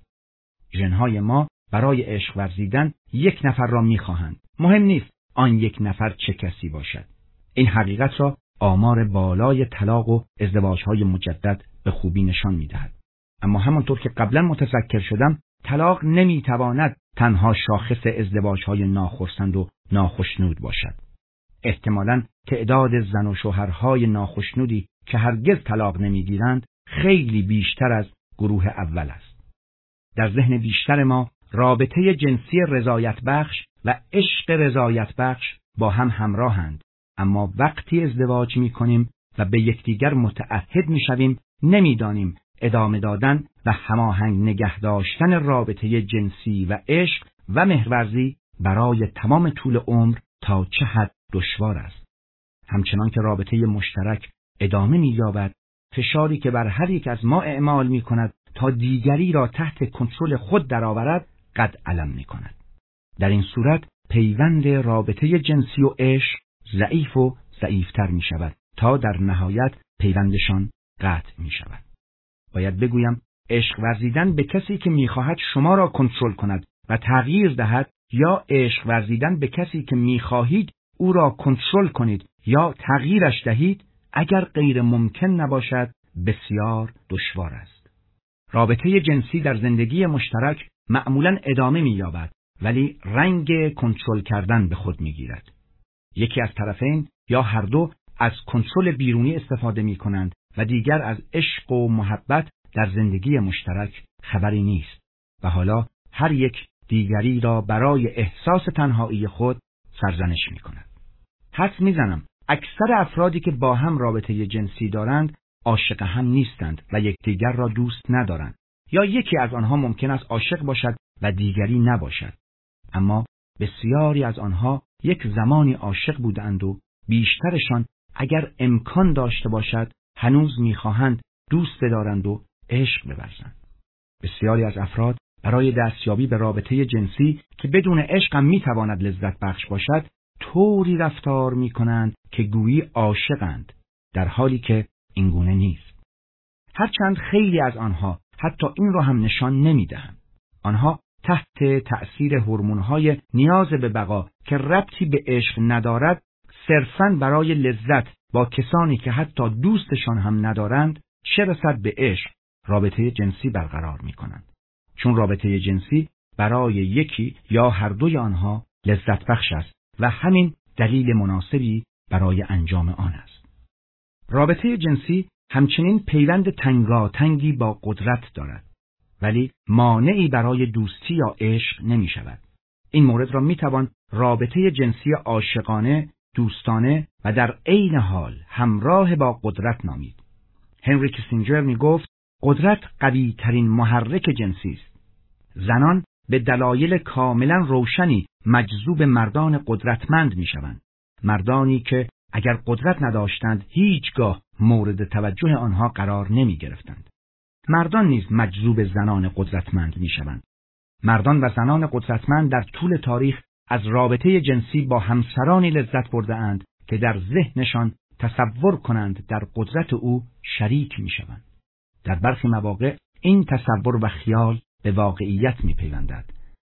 ژن‌های ما برای عشق ورزیدن یک نفر را می‌خواهند. مهم نیست آن یک نفر چه کسی باشد. این حقیقت را آمار بالای طلاق و ازدواج‌های مجدد به خوبی نشان می‌دهد. اما همانطور که قبلا متذکر شدم، طلاق نمی‌تواند تنها شاخص ازدواج‌های ناخرسند و ناخشنود باشد. احتمالاً تعداد زن و شوهرهای ناخشنودی که هرگز طلاق نمی‌گیرند خیلی بیشتر از گروه اول است. در ذهن بیشتر ما رابطه جنسی رضایت بخش و عشق رضایت بخش با هم همراهند، اما وقتی ازدواج می‌کنیم و به یکدیگر متعهد می‌شویم، نمی‌دانیم ادامه دادن و هماهنگ نگه داشتن رابطه جنسی و عشق و مهرورزی برای تمام طول عمر تا چه حد دشوار است. همچنان که رابطه مشترک ادامه می‌یابد، فشاری که بر هر یک از ما اعمال می‌کند تا دیگری را تحت کنترل خود درآورد قد علم می‌کند. در این صورت پیوند رابطه جنسی و عشق ضعیف و ضعیف‌تر می‌شود تا در نهایت پیوندشان قطع می‌شود. باید بگویم عشق ورزیدن به کسی که می‌خواهد شما را کنترل کند و تغییر دهد، یا عشق ورزیدن به کسی که می‌خواهید او را کنترل کنید یا تغییرش دهید، اگر غیر ممکن نباشد بسیار دشوار است. رابطه جنسی در زندگی مشترک معمولاً ادامه می‌یابد، ولی رنگ کنترل کردن به خود می‌گیرد. یکی از طرفین یا هر دو از کنترل بیرونی استفاده می‌کنند و دیگر از عشق و محبت در زندگی مشترک خبری نیست و حالا هر یک دیگری را برای احساس تنهایی خود سرزنش می‌کند. حدس می‌زنم اکثر افرادی که با هم رابطه جنسی دارند عاشق هم نیستند و یکدیگر را دوست ندارند، یا یکی از آنها ممکن است عاشق باشد و دیگری نباشد، اما بسیاری از آنها یک زمانی عاشق بودند و بیشترشان اگر امکان داشته باشد هنوز می‌خواهند دوست بدارند و عشق بورزند. بسیاری از افراد برای دستیابی به رابطه جنسی که بدون عشق هم می‌تواند لذت بخش باشد طوری رفتار می‌کنند که گویی عاشقند، در حالی که این گونه نیست. هرچند خیلی از آنها حتی این را هم نشان نمی‌دهند. آنها تحت تأثیر هورمون‌های نیاز به بقا که ربطی به عشق ندارد، صرفاً برای لذت با کسانی که حتی دوستشان هم ندارند، چه رسد به عشق، رابطه جنسی برقرار می‌کنند. چون رابطه جنسی برای یکی یا هر دوی آنها لذت بخش است و همین دلیل مناسبی برای انجام آن است. رابطه جنسی همچنین پیوند تنگاتنگی با قدرت دارد، ولی مانعی برای دوستی یا عشق نمی شود. این مورد را می توان رابطه جنسی عاشقانه، دوستانه و در عین حال همراه با قدرت نامید. هنری کیسینجر می گفت قدرت قوی ترین محرک جنسی است. زنان به دلایل کاملا روشنی مجذوب مردان قدرتمند می شوند. مردانی که اگر قدرت نداشتند هیچگاه مورد توجه آنها قرار نمی گرفتند. مردان نیز مجذوب زنان قدرتمند می شوند. مردان و زنان قدرتمند در طول تاریخ از رابطه جنسی با همسرانی لذت برده اند که در ذهنشان تصور کنند در قدرت او شریک می شوند. در برخی مواقع این تصور و خیال به واقعیت می پیوندد،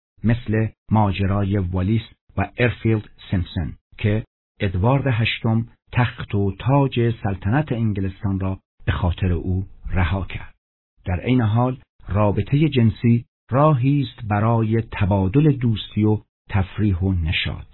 مثل ماجرای والیس و ارفیلد سیمپسون که ادوارد هشتم تخت و تاج سلطنت انگلستان را به خاطر او رها کرد. در عین حال رابطه جنسی راهی است برای تبادل دوستی و تفریح و نشاط.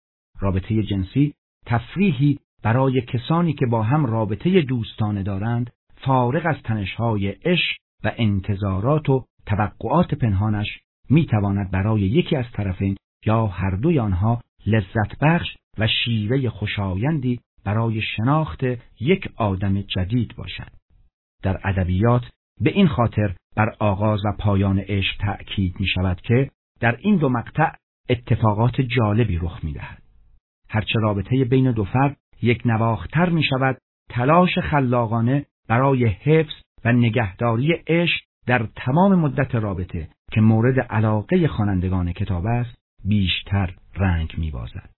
رابطه جنسی تفریحی برای کسانی که با هم رابطه دوستانه دارند، فارغ از تنش‌های عشق و انتظارات و توقعات پنهانش، میتواند برای یکی از طرفین یا هر دوی آنها لذت بخش و شیوه خوشایندی برای شناخت یک آدم جدید باشد. در ادبیات به این خاطر بر آغاز و پایان عشق تأکید می شود که در این دو مقطع اتفاقات جالبی رخ می دهد. هرچه رابطه بین دو فرد یک نواختر می شود، تلاش خلاقانه برای حفظ و نگهداری عشق در تمام مدت رابطه که مورد علاقه خوانندگان کتاب است بیشتر رنگ می بازد.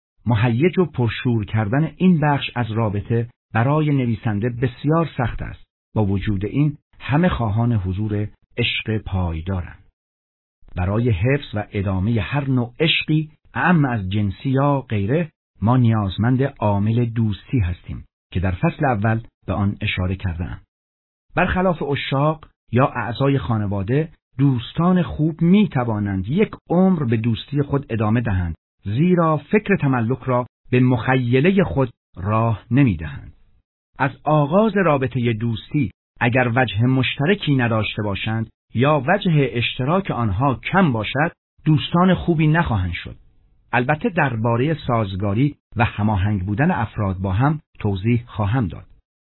مهیج و پرشور کردن این بخش از رابطه برای نویسنده بسیار سخت است. با وجود این همه خواهان حضور عشق پایدارند. برای حفظ و ادامه هر نوع عشقی، اعم از جنسی یا غیره، ما نیازمند عامل دوستی هستیم که در فصل اول به آن اشاره کردم. برخلاف عشاق یا اعضای خانواده، دوستان خوب می توانند یک عمر به دوستی خود ادامه دهند، زیرا فکر تملک را به مخیله خود راه نمی دهند. از آغاز رابطه دوستی اگر وجه مشترکی نداشته باشند یا وجه اشتراک آنها کم باشد، دوستان خوبی نخواهند شد. البته درباره سازگاری و هماهنگ بودن افراد با هم توضیح خواهم داد.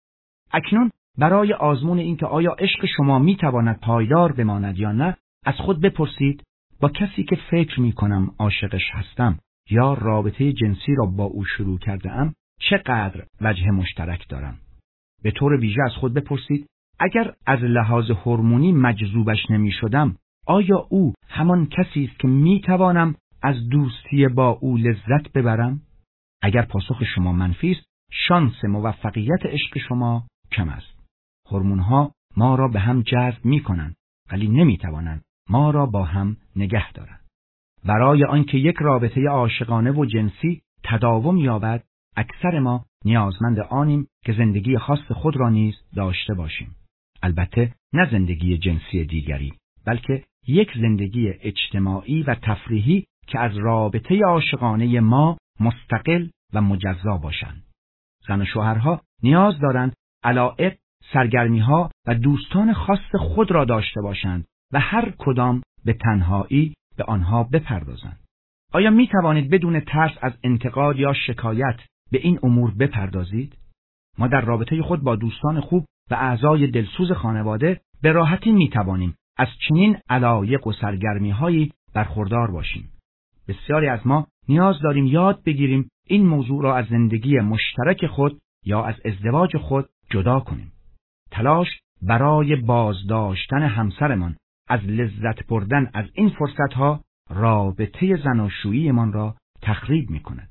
اکنون برای آزمون اینکه آیا عشق شما میتواند پایدار بماند یا نه، از خود بپرسید با کسی که فکر میکنم عاشقش هستم یا رابطه جنسی را با او شروع کرده ام چقدر وجه مشترک دارم. به طور ویژه از خود بپرسید اگر از لحاظ هورمونی مجذوبش نمی شدم، آیا او همان کسی است که می توانم از دوستی با او لذت ببرم؟ اگر پاسخ شما منفی است، شانس موفقیت عشق شما کم است. هورمون‌ها ما را به هم جذب می کنند ولی نمی توانند ما را با هم نگه دارند. برای آنکه یک رابطه عاشقانه و جنسی تداوم یابد، اکثر ما نیازمند آنیم که زندگی خاص خود را نیز داشته باشیم. البته نه زندگی جنسی دیگری، بلکه یک زندگی اجتماعی و تفریحی که از رابطه عاشقانه ما مستقل و مجزا باشند. زن و شوهرها نیاز دارند علایق، سرگرمی‌ها و دوستان خاص خود را داشته باشند و هر کدام به تنهایی به آنها بپردازند. آیا می توانید بدون ترس از انتقاد یا شکایت به این امور بپردازید؟ ما در رابطه خود با دوستان خوب و اعضای دلسوز خانواده به راحتی می توانیم از چنین علایق و سرگرمی‌هایی برخوردار باشیم. بسیاری از ما نیاز داریم یاد بگیریم این موضوع را از زندگی مشترک خود یا از ازدواج خود جدا کنیم. تلاش برای بازداشتن همسرمان از لذت بردن از این فرصتها رابطه زناشوییمان را تخریب می کند.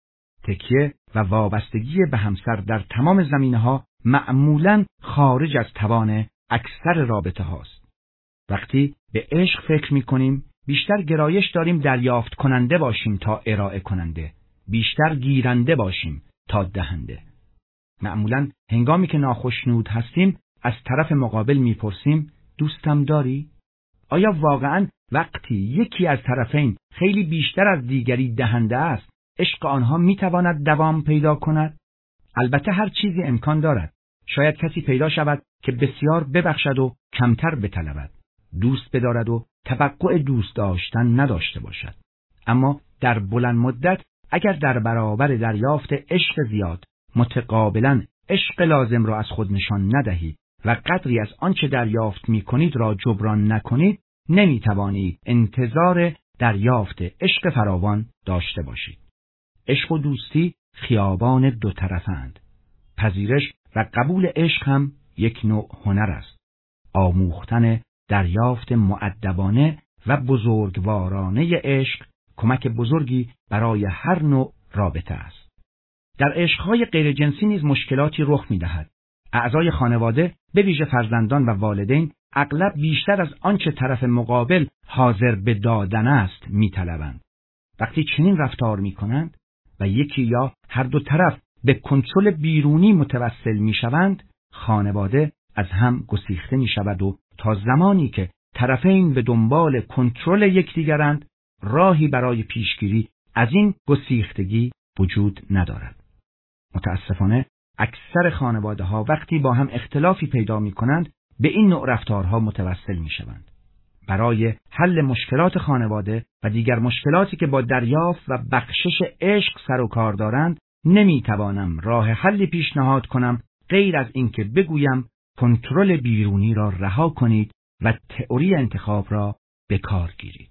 تکیه و وابستگی به همسر در تمام زمینه‌ها معمولاً خارج از توان اکثر رابطه هاست. وقتی به عشق فکر می کنیم، بیشتر گرایش داریم دریافت کننده باشیم تا ارائه کننده، بیشتر گیرنده باشیم تا دهنده. معمولاً هنگامی که ناخشنود هستیم از طرف مقابل میپرسیم دوستم داری؟ آیا واقعاً وقتی یکی از طرفین خیلی بیشتر از دیگری دهنده است، عشق آنها میتواند دوام پیدا کند؟ البته هر چیزی امکان دارد. شاید کسی پیدا شود که بسیار ببخشد و کمتر بطلبد، دوست بدارد و توقع دوست داشتن نداشته باشد. اما در بلند مدت اگر در برابر دریافت عشق زیاد متقابلاً عشق لازم را از خود نشان ندهید و قدری از آنچه دریافت می کنید را جبران نکنید، نمی توانید انتظار دریافت عشق فراوان داشته باشید. عشق و دوستی خیابان دو طرفند. پذیرش و قبول عشق هم یک نوع هنر است. آموختن دریافت مؤدبانه و بزرگوارانه عشق کمک بزرگی برای هر نوع رابطه است. در عشقهای غیر جنسی نیز مشکلاتی رخ می دهد. اعضای خانواده به ویژه فرزندان و والدین اغلب بیشتر از آنچه طرف مقابل حاضر به دادن است می طلبند. وقتی چنین رفتار می کنند و یکی یا هر دو طرف به کنترل بیرونی متوسل می شوند، خانواده از هم گسیخته می شود و تا زمانی که طرفین به دنبال کنترل یکدیگرند، راهی برای پیشگیری از این گسیختگی وجود ندارد. متاسفانه اکثر خانواده‌ها وقتی با هم اختلافی پیدا می‌کنند به این نوع رفتارها متوسل می‌شوند. برای حل مشکلات خانواده و دیگر مشکلاتی که با دریافت و بخشش عشق سر و کار دارند، نمی‌توانم راه حلی پیشنهاد کنم غیر از اینکه بگویم کنترل بیرونی را رها کنید و تئوری انتخاب را به کار گیرید.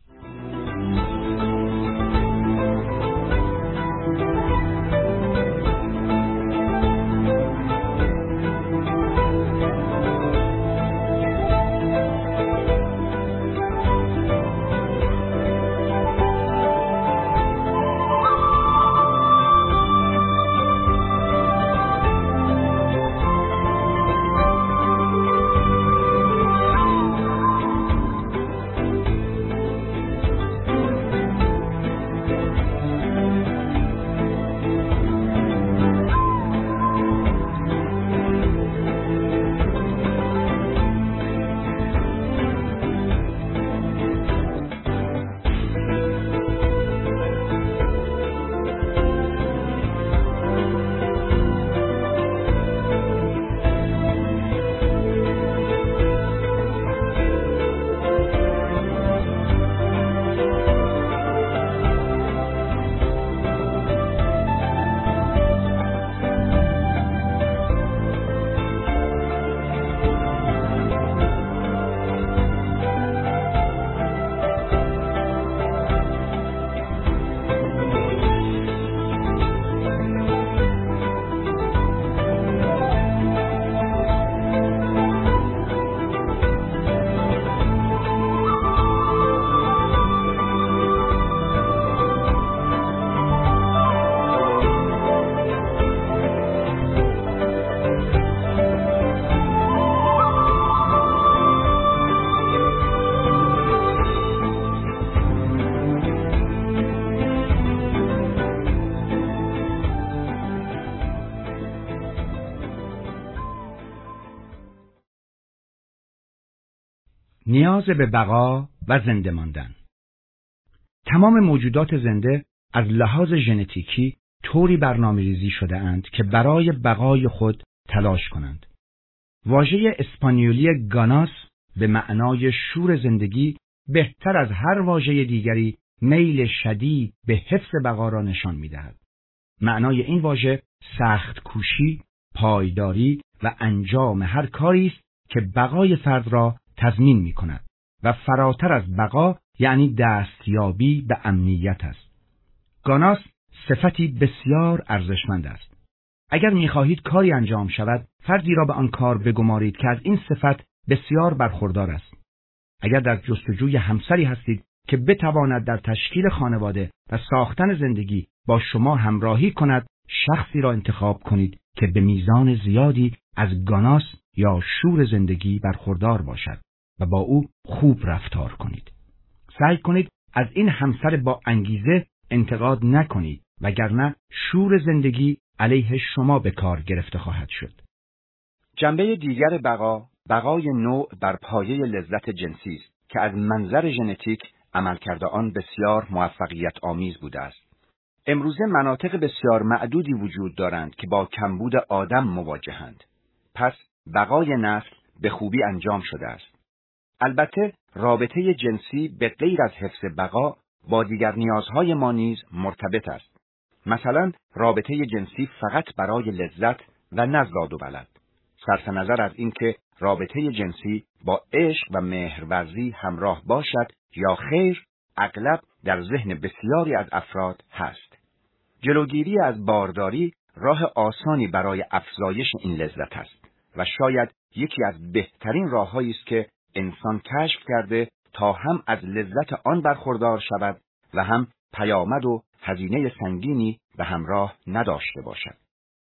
نیاز به بقا و زنده ماندن. تمام موجودات زنده از لحاظ ژنتیکی طوری برنامه‌ریزی شده اند که برای بقای خود تلاش کنند. واژه اسپانیولی گاناس به معنای شور زندگی بهتر از هر واژه دیگری میل شدید به حفظ بقا را نشان می‌دهد. معنای این واژه سخت کوشی، پایداری و انجام هر کاری است که بقای فرد را تضمین می‌کند و فراتر از بقا یعنی دستیابی به امنیت است. گاناس صفتی بسیار ارزشمند است. اگر می‌خواهید کاری انجام شود، فردی را به آن کار بگمارید که از این صفت بسیار برخوردار است. اگر در جستجوی همسری هستید که بتواند در تشکیل خانواده و ساختن زندگی با شما همراهی کند، شخصی را انتخاب کنید که به میزان زیادی از گاناس یا شور زندگی برخوردار باشد و با او خوب رفتار کنید. سعی کنید از این همسر با انگیزه انتقاد نکنید، وگرنه شور زندگی علیه شما به کار گرفته خواهد شد. جنبه دیگر بقا، بقای نوع بر پایه لذت جنسی است که از منظر ژنتیک عملکرد آن بسیار موفقیت آمیز بوده است. امروزه مناطق بسیار معدودی وجود دارند که با کمبود آدم مواجهند. پس بقای نسل به خوبی انجام شده است. البته رابطه جنسی به غیر از حفظ بقا با دیگر نیازهای ما نیز مرتبط است. مثلا رابطه جنسی فقط برای لذت و نه زاد و ولد. صرف نظر از اینکه رابطه جنسی با عشق و مهرورزی همراه باشد یا خیر، اغلب در ذهن بسیاری از افراد هست. جلوگیری از بارداری راه آسانی برای افزایش این لذت است و شاید یکی از بهترین راه‌هایی است که انسان کشف کرده تا هم از لذت آن برخوردار شود و هم پیامد و هزینه سنگینی به همراه نداشته باشد.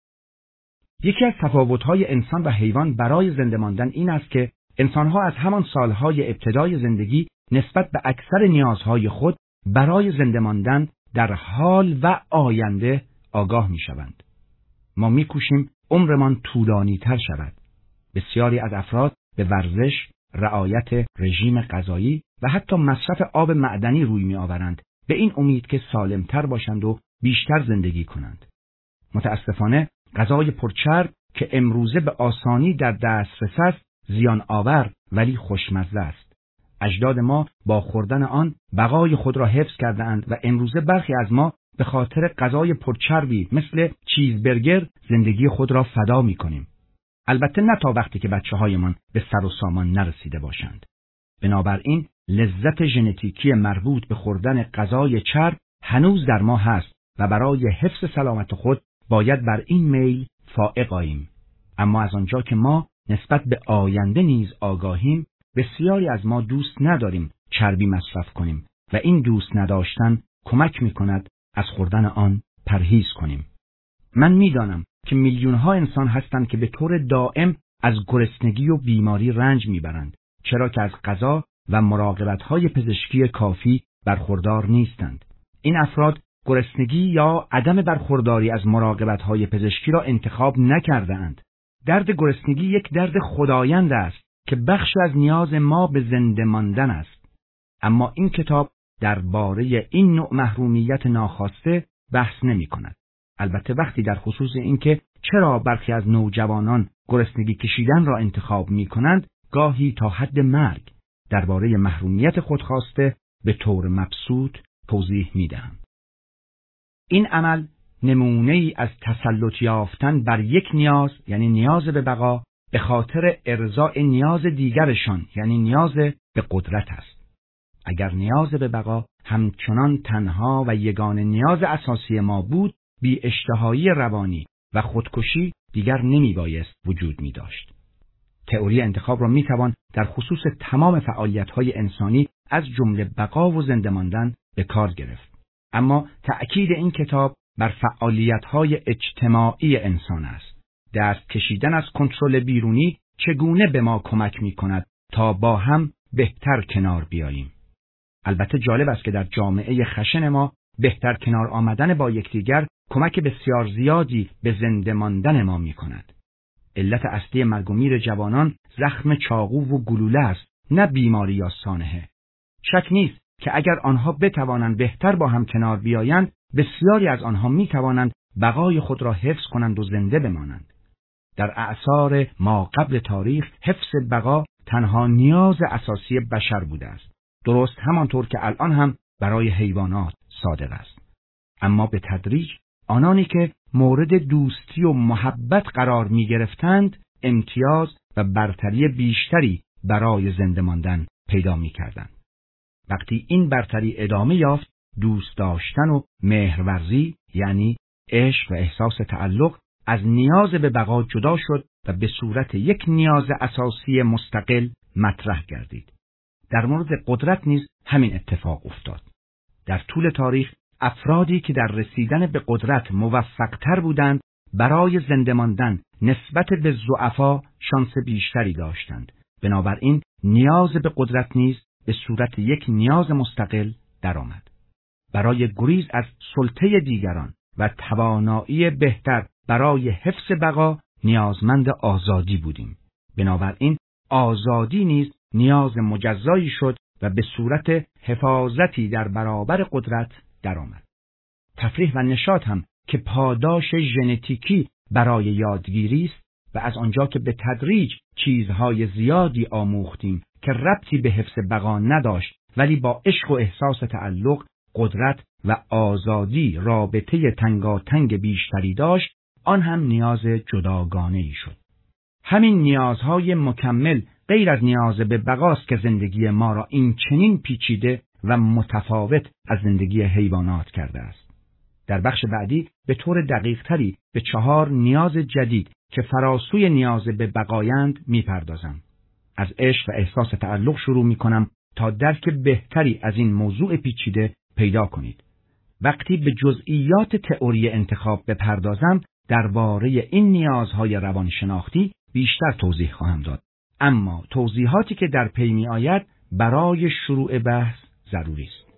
یکی از تفاوت‌های انسان و حیوان برای زنده ماندن این است که انسان‌ها از همان سالهای ابتدای زندگی نسبت به اکثر نیازهای خود برای زنده ماندن در حال و آینده آگاه می‌شوند. ما می‌کوشیم عمرمان طولانی‌تر شود. بسیاری از افراد به ورزش، رعایت رژیم غذایی و حتی مصرف آب معدنی روی می‌آورند، به این امید که سالمتر باشند و بیشتر زندگی کنند. متاسفانه غذای پرچرب که امروزه به آسانی در دسترس است، زیان آور ولی خوشمزه است. اجداد ما با خوردن آن بقای خود را حفظ کرده‌اند و امروزه برخی از ما به خاطر غذای پرچربی مثل چیزبرگر زندگی خود را فدا می‌کنیم. البته نه تا وقتی که بچه‌هایمان به سر و سامان نرسیده باشند. بنابراین لذت ژنتیکی مربوط به خوردن غذای چرب هنوز در ما هست و برای حفظ سلامت خود باید بر این میل فائق آییم. اما از آنجا که ما نسبت به آینده نیز آگاهیم، بسیاری از ما دوست نداریم چربی مصرف کنیم و این دوست نداشتن کمک می‌کند از خوردن آن پرهیز کنیم. من می‌دانم که میلیون‌ها انسان هستند که به طور دائم از گرسنگی و بیماری رنج می‌برند، چرا که از غذا و مراقبت‌های پزشکی کافی برخوردار نیستند. این افراد گرسنگی یا عدم برخورداری از مراقبت‌های پزشکی را انتخاب نکرده‌اند. درد گرسنگی یک درد خدایند است که بخشی از نیاز ما به زنده ماندن است. اما این کتاب درباره این نوع محرومیت ناخواسته بحث نمی‌کند. البته وقتی در خصوص اینکه چرا برخی از نوجوانان گرسنگی کشیدن را انتخاب می‌کنند، گاهی تا حد مرگ درباره محرومیت خودخواسته به طور مبسوط توضیح می‌دهم. این عمل نمونه‌ای از تسلط یافتن بر یک نیاز، یعنی نیاز به بقا، به خاطر ارضاء نیاز دیگرشان، یعنی نیاز به قدرت است. اگر نیاز به بقا همچنان تنها و یگانه نیاز اساسی ما بود، بی اشتهایی روانی و خودکشی دیگر نمی بایست وجود می داشت. تئوری انتخاب را می توان در خصوص تمام فعالیت‌های انسانی از جمله بقا و زنده ماندن به کار گرفت. اما تأکید این کتاب بر فعالیت‌های اجتماعی انسان است. دست کشیدن از کنترل بیرونی چگونه به ما کمک می‌کند تا با هم بهتر کنار بیاییم. البته جالب است که در جامعه خشن ما بهتر کنار آمدن با یکدیگر کمک بسیار زیادی به زنده ماندن ما می‌کند. علت اصلی مرگ و میر جوانان زخم چاقو و گلوله است، نه بیماری یا سانحه. شک نیست که اگر آنها بتوانند بهتر با هم کنار بیایند، بسیاری از آنها می‌توانند بقای خود را حفظ کنند و زنده بمانند. در اعصار ما قبل تاریخ حفظ بقا تنها نیاز اساسی بشر بوده است. درست همانطور که الان هم برای حیوانات صادق است. اما به تدریج آنانی که مورد دوستی و محبت قرار می گرفتند امتیاز و برتری بیشتری برای زنده ماندن پیدا می کردند. وقتی این برتری ادامه یافت، دوست داشتن و مهرورزی یعنی عشق و احساس تعلق از نیاز به بقا جدا شد و به صورت یک نیاز اساسی مستقل مطرح گردید. در مورد قدرت نیز همین اتفاق افتاد. در طول تاریخ افرادی که در رسیدن به قدرت موفق‌تر بودند برای زنده ماندن نسبت به ضعفا شانس بیشتری داشتند. بنابراین نیاز به قدرت نیز به صورت یک نیاز مستقل درآمد. برای گریز از سلطه دیگران و توانایی بهتر برای حفظ بقا نیازمند آزادی بودیم. بنابراین آزادی نیز نیاز مجزایی شد و به صورت حفاظتی در برابر قدرت درآمد. تفریح و نشاط هم که پاداش ژنتیکی برای یادگیری است و از آنجا که به تدریج چیزهای زیادی آموختیم که ربطی به حفظ بقا نداشت ولی با عشق و احساس تعلق، قدرت و آزادی رابطه تنگاتنگ بیشتری داشت، آن هم نیاز جداگانه‌ای شد. همین نیازهای مکمل غیر از نیاز به بقاست که زندگی ما را این چنین پیچیده و متفاوت از زندگی حیوانات کرده است. در بخش بعدی به طور دقیق تری به چهار نیاز جدید که فراسوی نیاز به بقایند میپردازم. از عشق و احساس تعلق شروع میکنم تا درک بهتری از این موضوع پیچیده پیدا کنید. وقتی به جزئیات تئوری انتخاب بپردازم درباره این نیازهای روانشناختی بیشتر توضیح خواهم داد. اما توضیحاتی که در پی می آید برای شروع بحث ضروری است.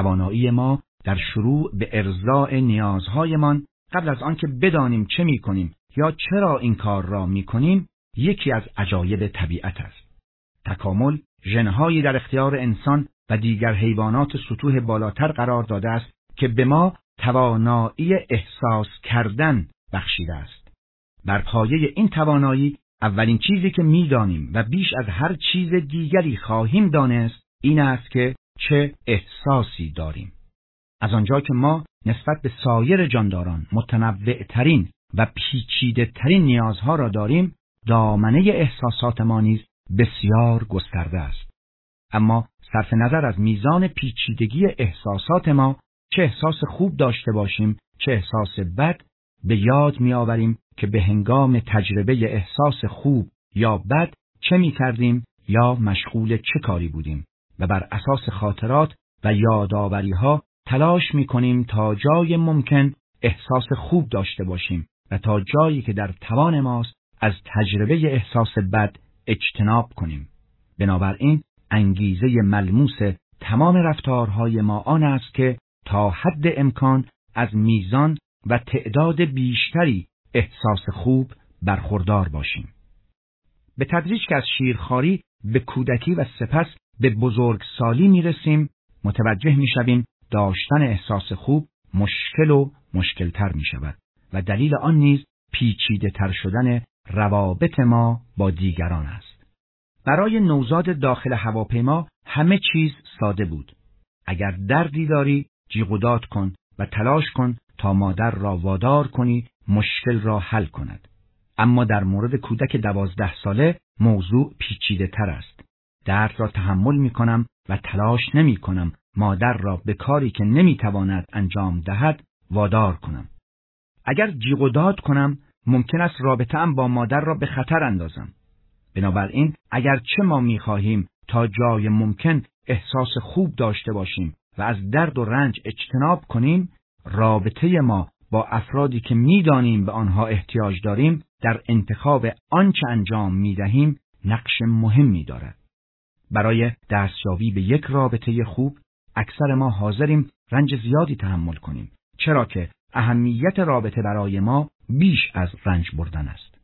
توانایی ما در شروع به ارضاء نیازهایمان قبل از آنکه بدانیم چه می‌کنیم یا چرا این کار را می‌کنیم یکی از عجایب طبیعت است. تکامل ژن‌هایی در اختیار انسان و دیگر حیوانات سطوح بالاتر قرار داده است که به ما توانایی احساس کردن بخشیده است. بر پایه این توانایی اولین چیزی که می‌دانیم و بیش از هر چیز دیگری خواهیم دانست این است که چه احساسی داریم. از آنجا که ما نسبت به سایر جانداران متنوع‌ترین و پیچیده‌ترین نیازها را داریم، دامنه احساسات ما نیز بسیار گسترده است. اما صرف نظر از میزان پیچیدگی احساسات ما، چه احساس خوب داشته باشیم چه احساس بد، به یاد می‌آوریم که به هنگام تجربه احساس خوب یا بد چه می‌کردیم یا مشغول چه کاری بودیم و بر اساس خاطرات و یادآوری‌ها تلاش می‌کنیم تا جای ممکن احساس خوب داشته باشیم و تا جایی که در توان ماست از تجربه احساس بد اجتناب کنیم. بنابراین انگیزه ملموس تمام رفتارهای ما آن است که تا حد امکان از میزان و تعداد بیشتری احساس خوب برخوردار باشیم. به تدریج که از شیرخواری به کودکی و سپس به بزرگسالی میرسیم، متوجه میشویم داشتن احساس خوب مشکل و مشکلتر می شود و دلیل آن نیز پیچیده تر شدن روابط ما با دیگران است. برای نوزاد داخل هواپیما همه چیز ساده بود. اگر دردی داری جیغ و داد کن و تلاش کن تا مادر را وادار کنی مشکل را حل کند. اما در مورد کودک دوازده ساله موضوع پیچیده تر است. درد را تحمل می کنم و تلاش نمی کنم مادر را به کاری که نمی تواند انجام دهد وادار کنم. اگر جیغ و داد کنم ممکن است رابطه‌ام با مادر را به خطر اندازم. بنابراین اگر چه ما می خواهیم تا جای ممکن احساس خوب داشته باشیم و از درد و رنج اجتناب کنیم، رابطه ما با افرادی که می دانیم به آنها احتیاج داریم در انتخاب آنچه انجام می دهیم نقش مهمی دارد. برای دستیابی به یک رابطه خوب اکثر ما حاضریم رنج زیادی تحمل کنیم، چرا که اهمیت رابطه برای ما بیش از رنج بردن است.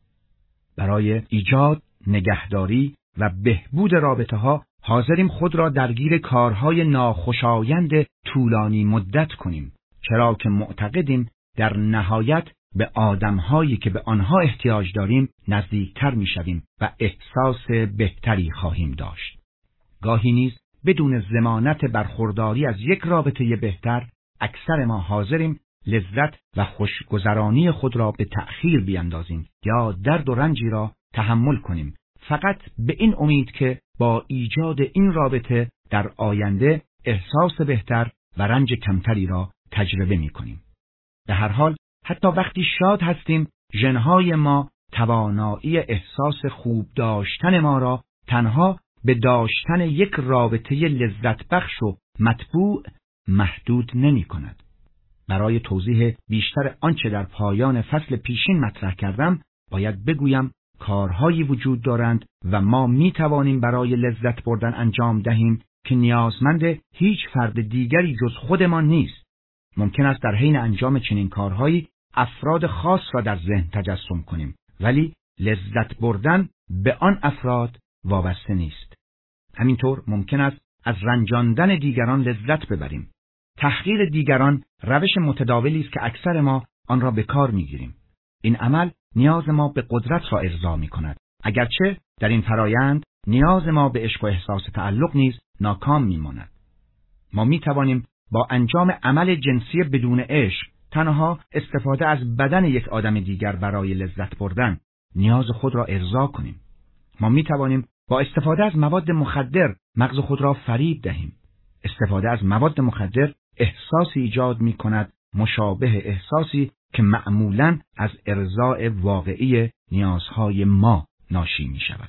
برای ایجاد، نگهداری و بهبود رابطه ها حاضریم خود را درگیر کارهای ناخوشایند طولانی مدت کنیم، چرا که معتقدیم در نهایت به آدمهایی که به آنها احتیاج داریم نزدیکتر میشویم و احساس بهتری خواهیم داشت. گاهی نیز بدون ضمانت برخورداری از یک رابطه بهتر اکثر ما حاضریم لذت و خوشگذرانی خود را به تأخیر بیندازیم یا درد و رنجی را تحمل کنیم فقط به این امید که با ایجاد این رابطه در آینده احساس بهتر و رنج کمتری را تجربه می کنیم. به هر حال حتی وقتی شاد هستیم ژن‌های ما توانایی احساس خوب داشتن ما را تنها به داشتن یک رابطه لذت بخش و مطبوع محدود نمی کند. برای توضیح بیشتر آنچه در پایان فصل پیشین مطرح کردم باید بگویم کارهایی وجود دارند و ما می توانیم برای لذت بردن انجام دهیم که نیازمند هیچ فرد دیگری جز خودمان نیست. ممکن است در حین انجام چنین کارهایی افراد خاص را در ذهن تجسم کنیم، ولی لذت بردن به آن افراد وابسته نیست. همینطور ممکن است از رنجاندن دیگران لذت ببریم. تحقیر دیگران روش متداولی است که اکثر ما آن را به کار می‌گیریم. این عمل نیاز ما به قدرت را ارضا می‌کند، اگرچه در این فرایند نیاز ما به عشق و احساس تعلق نیز ناکام می‌ماند. ما می‌توانیم با انجام عمل جنسی بدون عشق، تنها استفاده از بدن یک آدم دیگر برای لذت بردن، نیاز خود را ارضا کنیم. ما می‌توانیم با استفاده از مواد مخدر مغز خود را فریب دهیم. استفاده از مواد مخدر احساسی ایجاد می‌کند مشابه احساسی که معمولاً از ارضاء واقعی نیازهای ما ناشی می‌شود.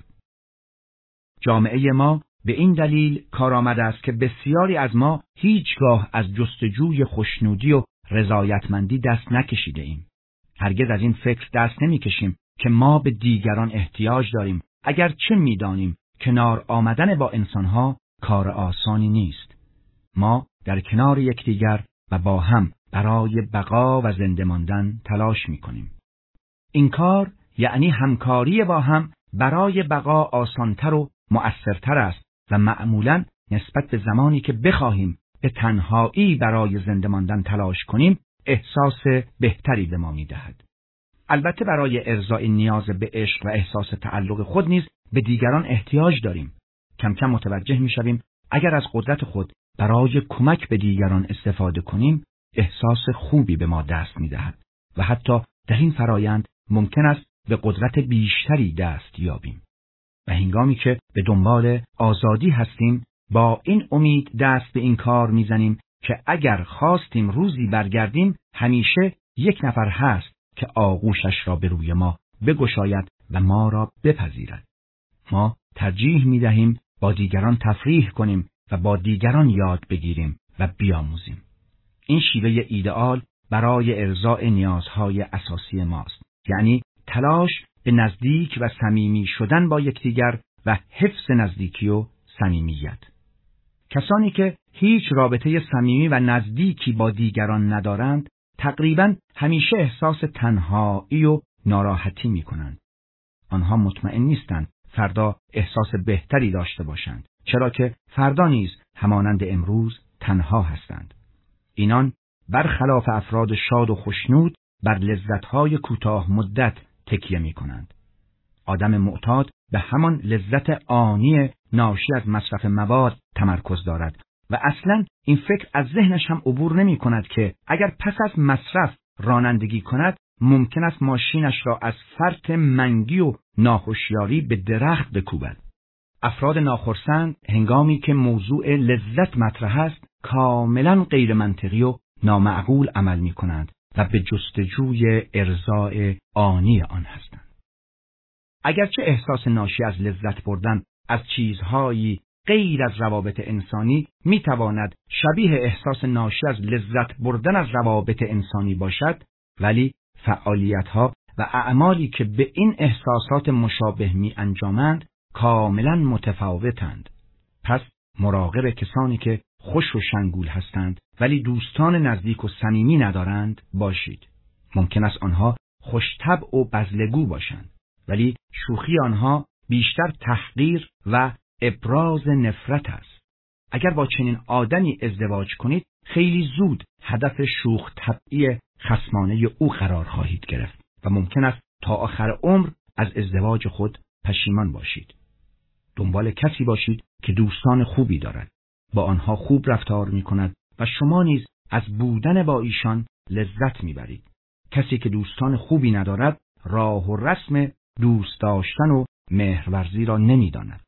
جامعه ما به این دلیل کارآمد است که بسیاری از ما هیچگاه از جستجوی خوشنودی و رضایتمندی دست نکشیده ایم. هرگز از این فکر دست نمی‌کشیم که ما به دیگران احتیاج داریم، اگر چه می‌دانیم کنار آمدن با انسانها کار آسانی نیست. ما در کنار یکدیگر و با هم برای بقا و زنده ماندن تلاش می‌کنیم. این کار یعنی همکاری با هم برای بقا آسانتر و مؤثرتر است و معمولاً نسبت به زمانی که بخواهیم به تنهایی برای زنده ماندن تلاش کنیم احساس بهتری به ما می‌دهد. البته برای ارضای نیاز به عشق و احساس تعلق خود نیز به دیگران احتیاج داریم. کم کم متوجه می‌شویم اگر از قدرت خود برای کمک به دیگران استفاده کنیم احساس خوبی به ما دست می‌دهد و حتی در این فرایند ممکن است به قدرت بیشتری دست یابیم. و هنگامی که به دنبال آزادی هستیم با این امید دست به این کار می‌زنیم که اگر خواستیم روزی برگردیم همیشه یک نفر هست که آغوشش را به روی ما بگشاید و ما را بپذیرد. ما ترجیح می‌دهیم با دیگران تفریح کنیم و با دیگران یاد بگیریم و بیاموزیم. این شیوه ایدئال برای ارضاء نیازهای اساسی ماست، یعنی تلاش به نزدیک و صمیمی شدن با یکدیگر و حفظ نزدیکی و صمیمیت. کسانی که هیچ رابطه صمیمی و نزدیکی با دیگران ندارند تقریباً همیشه احساس تنهایی و ناراحتی می‌کنند. آنها مطمئن نیستند فردا احساس بهتری داشته باشند، چرا که فردا نیز همانند امروز تنها هستند. اینان برخلاف افراد شاد و خوشنود بر لذت‌های کوتاه مدت تکیه می‌کنند. آدم معتاد به همان لذت آنی ناشی از مصرف مواد تمرکز دارد و اصلاً این فکر از ذهنش هم عبور نمی‌کند که اگر پس از مصرف رانندگی کند ممکن است ماشینش را از فرط منگی و ناهوشیاری به درخت بکوبد. افراد ناخرسند هنگامی که موضوع لذت مطرح است کاملاً غیر منطقی و نامعقول عمل می‌کنند و به جستجوی ارضاء آنی آن هستند. اگرچه احساس ناشی از لذت بردن از چیزهایی غیر از روابط انسانی می‌تواند شبیه احساس ناشی از لذت بردن از روابط انسانی باشد، ولی فعالیت‌ها و اعمالی که به این احساسات مشابه می‌انجامند کاملاً متفاوتند. پس مراقب کسانی که خوش و شنگول هستند ولی دوستان نزدیک و صمیمی ندارند باشید. ممکن است آنها خوش‌طبع و بزلگو باشند، ولی شوخی آنها بیشتر تحقیر و ابراز نفرت است. اگر با چنین آدمی ازدواج کنید خیلی زود هدف شوخ طبعی خصمانه او قرار خواهید گرفت و ممکن است تا آخر عمر از ازدواج خود پشیمان باشید. دنبال کسی باشید که دوستان خوبی دارد، با آنها خوب رفتار می کند و شما نیز از بودن با ایشان لذت می برید. کسی که دوستان خوبی ندارد راه و رسم دوست داشتن و مهرورزی را نمی داند.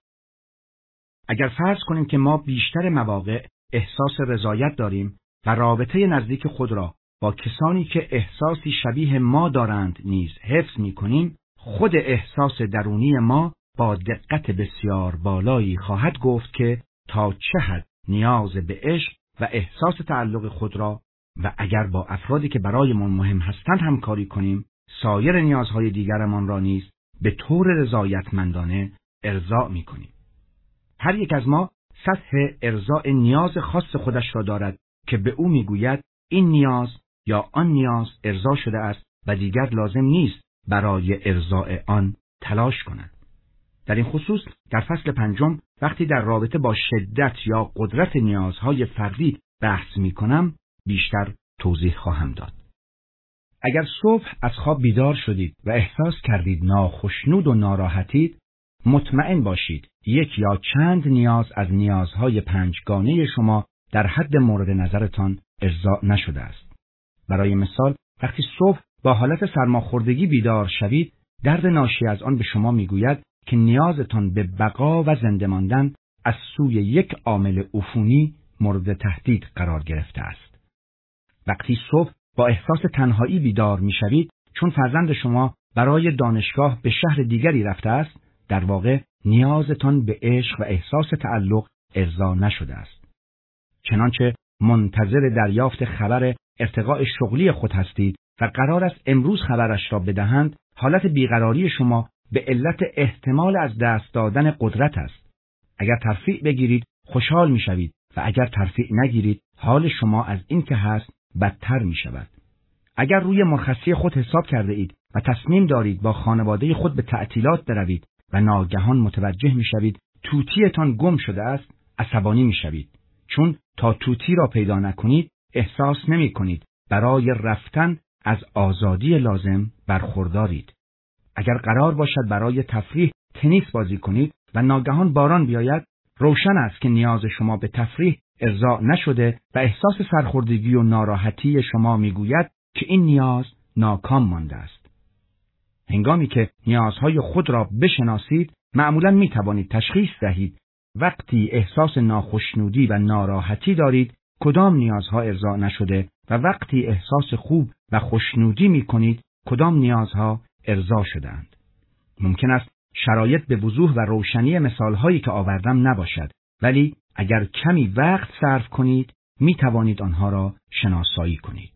اگر فرض کنیم که ما بیشتر مواقع احساس رضایت داریم و رابطه نزدیک خود را با کسانی که احساسی شبیه ما دارند نیز حفظ می کنیم، خود احساس درونی ما با دقت بسیار بالایی خواهد گفت که تا چه حد نیاز به عشق و احساس تعلق خود را و اگر با افرادی که برایمان مهم هستند همکاری کنیم، سایر نیازهای دیگرمان را نیز به طور رضایتمندانه ارضا می کنیم. هر یک از ما سطح ارضاء نیاز خاص خودش را دارد که به او میگوید این نیاز یا آن نیاز ارضا شده است و دیگر لازم نیست برای ارضاء آن تلاش کند. در این خصوص در فصل پنجم وقتی در رابطه با شدت یا قدرت نیازهای فردی بحث می کنم بیشتر توضیح خواهم داد. اگر صبح از خواب بیدار شدید و احساس کردید ناخشنود و ناراحتید، مطمئن باشید یک یا چند نیاز از نیازهای پنجگانه شما در حد مورد نظرتان ارضا نشده است. برای مثال وقتی صبح با حالت سرماخوردگی بیدار شوید، درد ناشی از آن به شما میگوید که نیازتان به بقا و زنده ماندن از سوی یک عامل عفونی مورد تهدید قرار گرفته است. وقتی صبح با احساس تنهایی بیدار میشوید چون فرزند شما برای دانشگاه به شهر دیگری رفته است، در واقع نیازتان به عشق و احساس تعلق ارضا نشده است. چنانچه منتظر دریافت خبر ارتقاء شغلی خود هستید و قرار است امروز خبرش را بدهند، حالت بیقراری شما به علت احتمال از دست دادن قدرت است. اگر ترفیع بگیرید خوشحال میشوید و اگر ترفیع نگیرید حال شما از این که هست بدتر می شود. اگر روی مرخصی خود حساب کرده اید و تصمیم دارید با خانواده خود به تعطیلات بروید و ناگهان متوجه می شوید توتیتان گم شده است، عصبانی می شوید. چون تا توتی را پیدا نکنید احساس نمی کنید برای رفتن از آزادی لازم برخوردارید. اگر قرار باشد برای تفریح تنیس بازی کنید و ناگهان باران بیاید، روشن است که نیاز شما به تفریح ارضا نشده و احساس سرخوردگی و ناراحتی شما میگوید که این نیاز ناکام مانده است. هنگامی که نیازهای خود را بشناسید، معمولاً می توانید تشخیص دهید وقتی احساس ناخشنودی و ناراحتی دارید کدام نیازها ارضا نشده و وقتی احساس خوب و خوشنودی می کنید کدام نیازها ارضا شدند. ممکن است شرایط به وضوح و روشنی مثالهایی که آوردم نباشد، ولی اگر کمی وقت صرف کنید می توانید آنها را شناسایی کنید.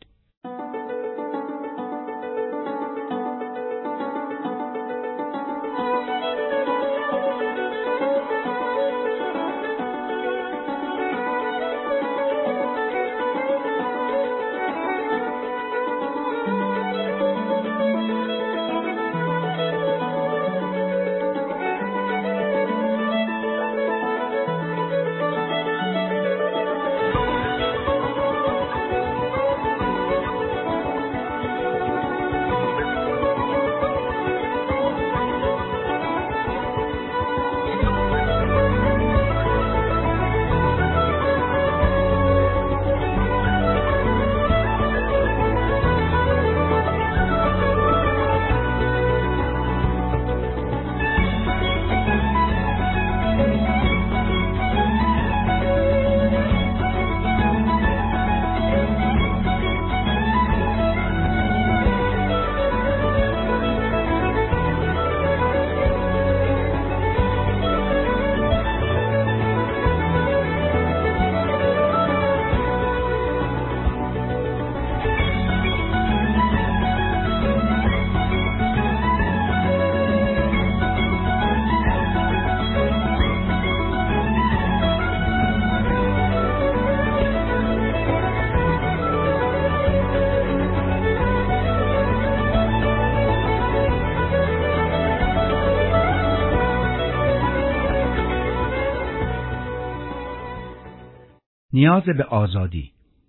نیاز به آزادی.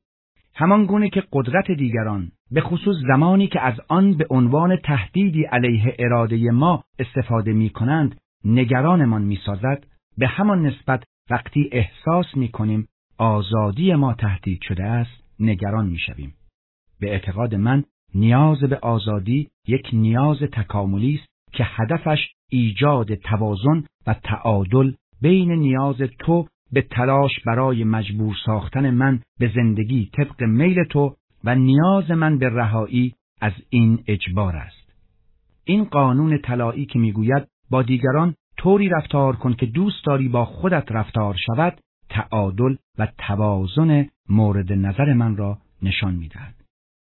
همان گونه که قدرت دیگران به خصوص زمانی که از آن به عنوان تهدیدی علیه اراده ما استفاده می کنند نگرانمان می سازد، به همان نسبت وقتی احساس می کنیم آزادی ما تهدید شده است نگران می شویم. به اعتقاد من نیاز به آزادی یک نیاز تکاملی است که هدفش ایجاد توازن و تعادل بین نیاز تو به تلاش برای مجبور ساختن من به زندگی طبق میل تو و نیاز من به رهایی از این اجبار است. این قانون طلایی که میگوید با دیگران طوری رفتار کن که دوست داری با خودت رفتار شود، تعادل و توازن مورد نظر من را نشان میدهد.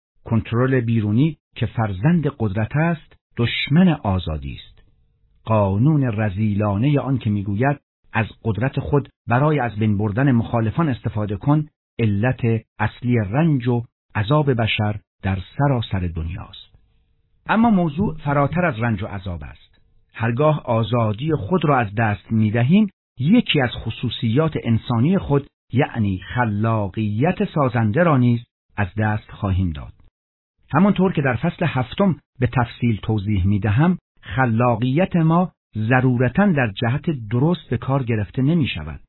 کنترل بیرونی که فرزند قدرت است، دشمن آزادی است. قانون رذیلانه آن که میگوید از قدرت خود برای از بین بردن مخالفان استفاده کن، علت اصلی رنج و عذاب بشر در سراسر دنیاست. اما موضوع فراتر از رنج و عذاب است. هرگاه آزادی خود را از دست می‌دهیم، یکی از خصوصیات انسانی خود، یعنی خلاقیت سازنده را نیز از دست خواهیم داد. همانطور که در فصل هفتم به تفصیل توضیح می‌دهم، خلاقیت ما ضرورتاً در جهت درست به کار گرفته نمی شود.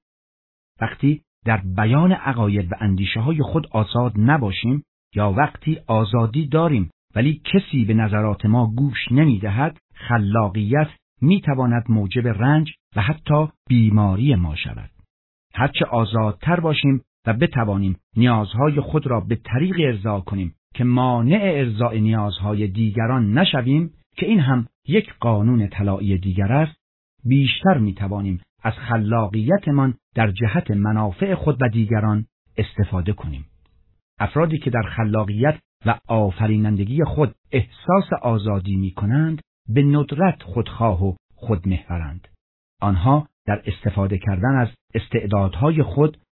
وقتی در بیان عقاید و اندیشه های خود آزاد نباشیم یا وقتی آزادی داریم ولی کسی به نظرات ما گوش نمی دهد، خلاقیت می تواند موجب رنج و حتی بیماری ما شود. هرچه آزادتر باشیم و بتوانیم نیازهای خود را به طریق ارضا کنیم که مانع ارضاء نیازهای دیگران نشویم، که این هم یک قانون طلایی دیگر است، بیشتر می توانیم از خلاقیتمان در جهت منافع خود و دیگران استفاده کنیم. افرادی که در خلاقیت و آفرینندگی خود احساس آزادی می کنند، به ندرت خودخواه و خودمحورند. آنها در استفاده کردن از استعدادهای خود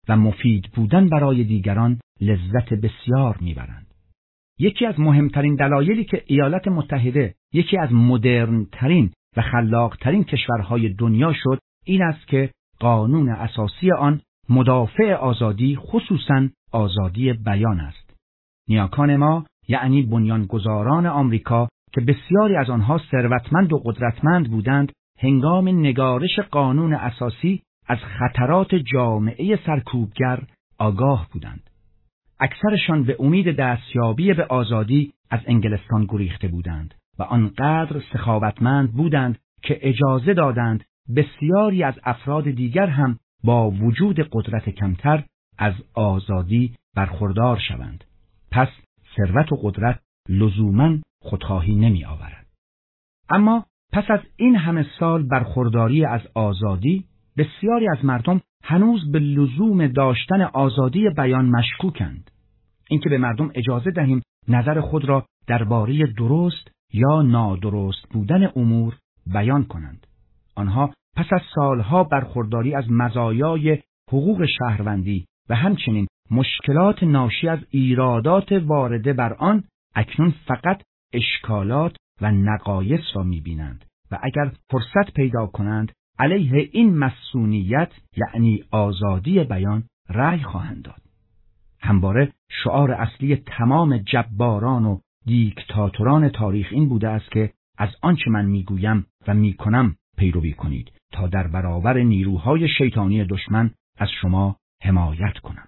و مفید بودن برای دیگران لذت بسیار میبرند. یکی از مهمترین دلایلی که ایالات متحده یکی از مدرنترین و خلاقترین کشورهای دنیا شد این است که قانون اساسی آن مدافع آزادی خصوصاً آزادی بیان است. نیاکان ما یعنی بنیانگذاران آمریکا که بسیاری از آنها ثروتمند و قدرتمند بودند هنگام نگارش قانون اساسی از خطرات جامعه سرکوبگر آگاه بودند. اکثرشان به امید دستیابی به آزادی از انگلستان گریخته بودند و آنقدر سخاوتمند بودند که اجازه دادند بسیاری از افراد دیگر هم با وجود قدرت کمتر از آزادی برخوردار شوند. پس ثروت و قدرت لزوماً خودخواهی نمی آورد. اما پس از این همه سال برخورداری از آزادی بسیاری از مردم هنوز به لزوم داشتن آزادی بیان مشکوکند. اینکه به مردم اجازه دهیم نظر خود را درباره درست یا نادرست بودن امور بیان کنند. آنها پس از سالها برخورداری از مزایای حقوق شهروندی و همچنین مشکلات ناشی از ایرادات وارده بر آن اکنون فقط اشکالات و نقایص را می‌بینند و اگر فرصت پیدا کنند علیه این مسئولیت یعنی آزادی بیان رأی خواهند داد. همواره شعار اصلی تمام جباران و دیکتاتوران تاریخ این بوده است که از آنچه من میگویم و میکنم پیروی کنید تا در برابر نیروهای شیطانی دشمن از شما حمایت کنم.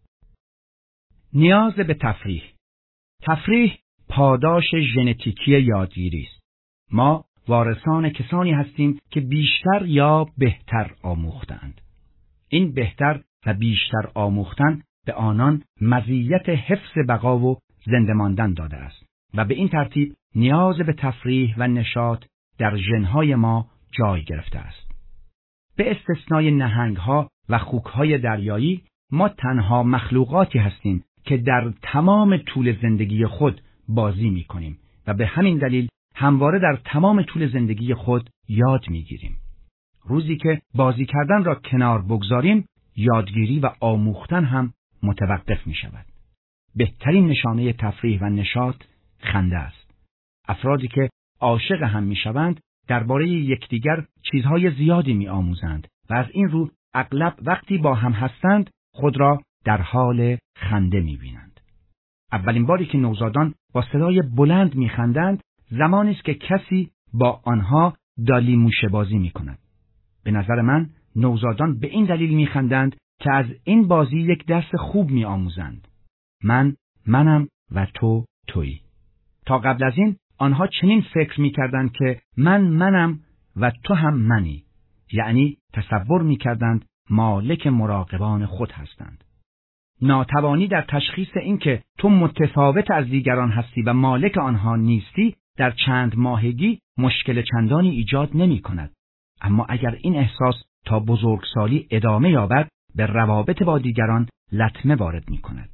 نیاز به تفریح. تفریح پاداش ژنتیکی یادگیری است. ما وارثان کسانی هستیم که بیشتر یا بهتر آموختند. این بهتر و بیشتر آموختن به آنان مزیت حفظ بقا و زنده ماندن داده است و به این ترتیب نیاز به تفریح و نشاط در ژن‌های ما جای گرفته است. به استثنای نهنگ‌ها و خوک‌های دریایی ما تنها مخلوقاتی هستیم که در تمام طول زندگی خود بازی می‌کنیم و به همین دلیل همواره در تمام طول زندگی خود یاد می‌گیریم. روزی که بازی کردن را کنار بگذاریم، یادگیری و آموختن هم متوقف می‌شود. بهترین نشانه تفریح و نشاط خنده است. افرادی که عاشق هم می‌شوند درباره یکدیگر چیزهای زیادی می‌آموزند و از این رو اغلب وقتی با هم هستند خود را در حال خنده می‌بینند. اولین باری که نوزادان با صدای بلند می‌خندند زمانی است که کسی با آنها دالی موشه بازی می‌کند. به نظر من نوزادان به این دلیل می‌خندند که از این بازی یک درس خوب می‌آموزند. من منم و تو تویی. تا قبل از این آنها چنین فکر می‌کردند که من منم و تو هم منی، یعنی تصور می‌کردند مالک مراقبان خود هستند. ناتوانی در تشخیص این که تو متفاوت از دیگران هستی و مالک آنها نیستی در چند ماهگی مشکل چندانی ایجاد نمی‌کند. اما اگر این احساس تا بزرگسالی ادامه یابد به روابط با دیگران لطمه وارد می‌کند.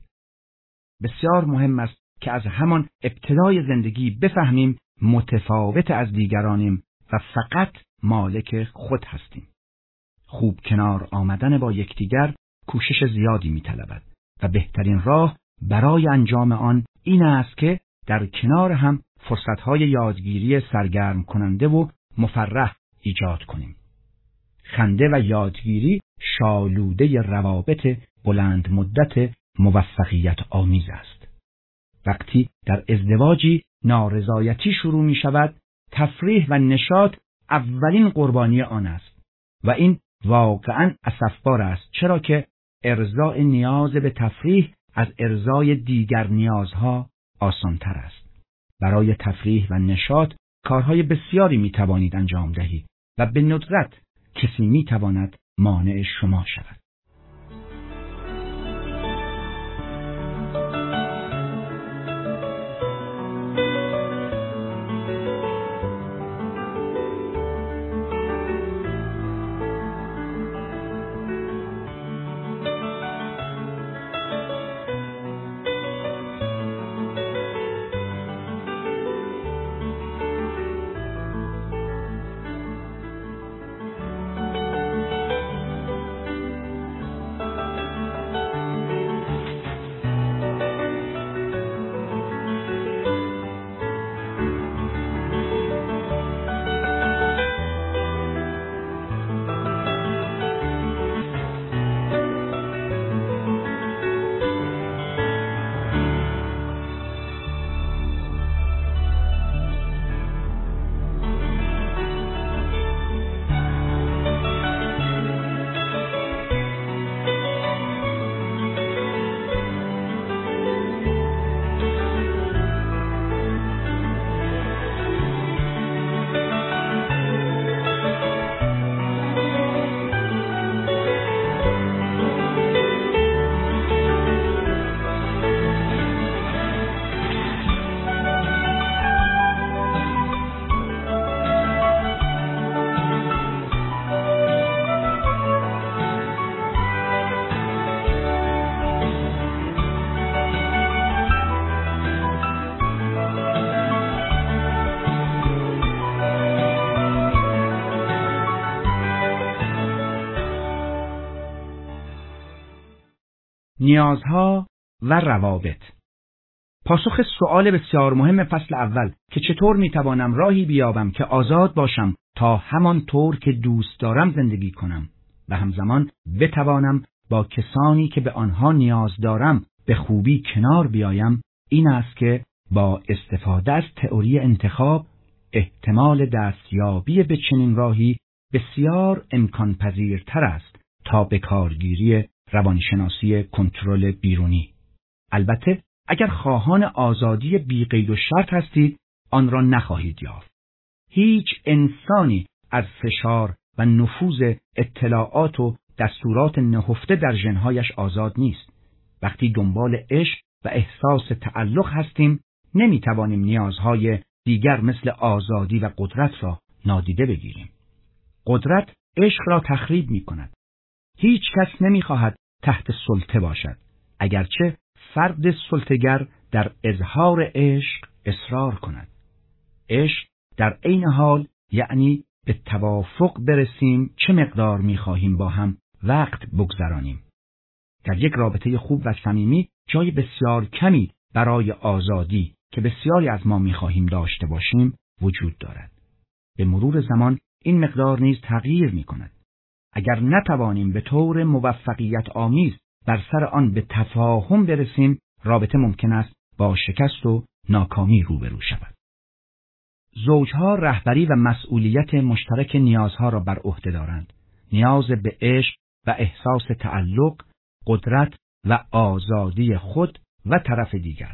بسیار مهم است که از همان ابتدای زندگی بفهمیم متفاوت از دیگرانیم و فقط مالک خود هستیم. خوب کنار آمدن با یکدیگر کوشش زیادی می‌طلبد و بهترین راه برای انجام آن این است که در کنار هم فرصت‌های یادگیری سرگرم کننده و مفرح ایجاد کنیم. خنده و یادگیری شالوده روابط بلند مدت موفقیت آمیز است. وقتی در ازدواجی نارضایتی شروع می شود، تفریح و نشاط اولین قربانی آن است و این واقعاً اسفبار است، چرا که ارضاء نیاز به تفریح از ارضای دیگر نیازها آسان‌تر است. برای تفریح و نشاط کارهای بسیاری می توانید انجام دهید و به ندرت کسی می تواند مانع شما شود. نیازها و روابط. پاسخ سؤال بسیار مهم فصل اول که چطور میتوانم راهی بیابم که آزاد باشم تا همان طور که دوست دارم زندگی کنم و همزمان بتوانم با کسانی که به آنها نیاز دارم به خوبی کنار بیایم، این است که با استفاده از تئوری انتخاب احتمال دستیابی به چنین راهی بسیار امکان پذیرتر است تا به کارگیری روانشناسی کنترل بیرونی. البته اگر خواهان آزادی بی قید و شرط هستید، آن را نخواهید یافت. هیچ انسانی از فشار و نفوذ اطلاعات و دستورات نهفته در ژن‌هایش آزاد نیست. وقتی دنبال عشق و احساس تعلق هستیم، نمیتوانیم نیازهای دیگر مثل آزادی و قدرت را نادیده بگیریم. قدرت عشق را تخریب می کند. هیچ کس نمیخواهد تحت سلطه باشد، اگرچه فرد سلطه‌گر در اظهار عشق اصرار کند. عشق در عین حال یعنی به توافق برسیم چه مقدار میخواهیم با هم وقت بگذرانیم. در یک رابطه خوب و صمیمی جای بسیار کمی برای آزادی که بسیاری از ما میخواهیم داشته باشیم وجود دارد. به مرور زمان این مقدار نیز تغییر میکند. اگر نتوانیم به طور موفقیت آمیز بر سر آن به تفاهم برسیم، رابطه ممکن است با شکست و ناکامی روبرو شود. زوجها رهبری و مسئولیت مشترک نیازها را بر عهده دارند. نیاز به عشق و احساس تعلق، قدرت و آزادی خود و طرف دیگر.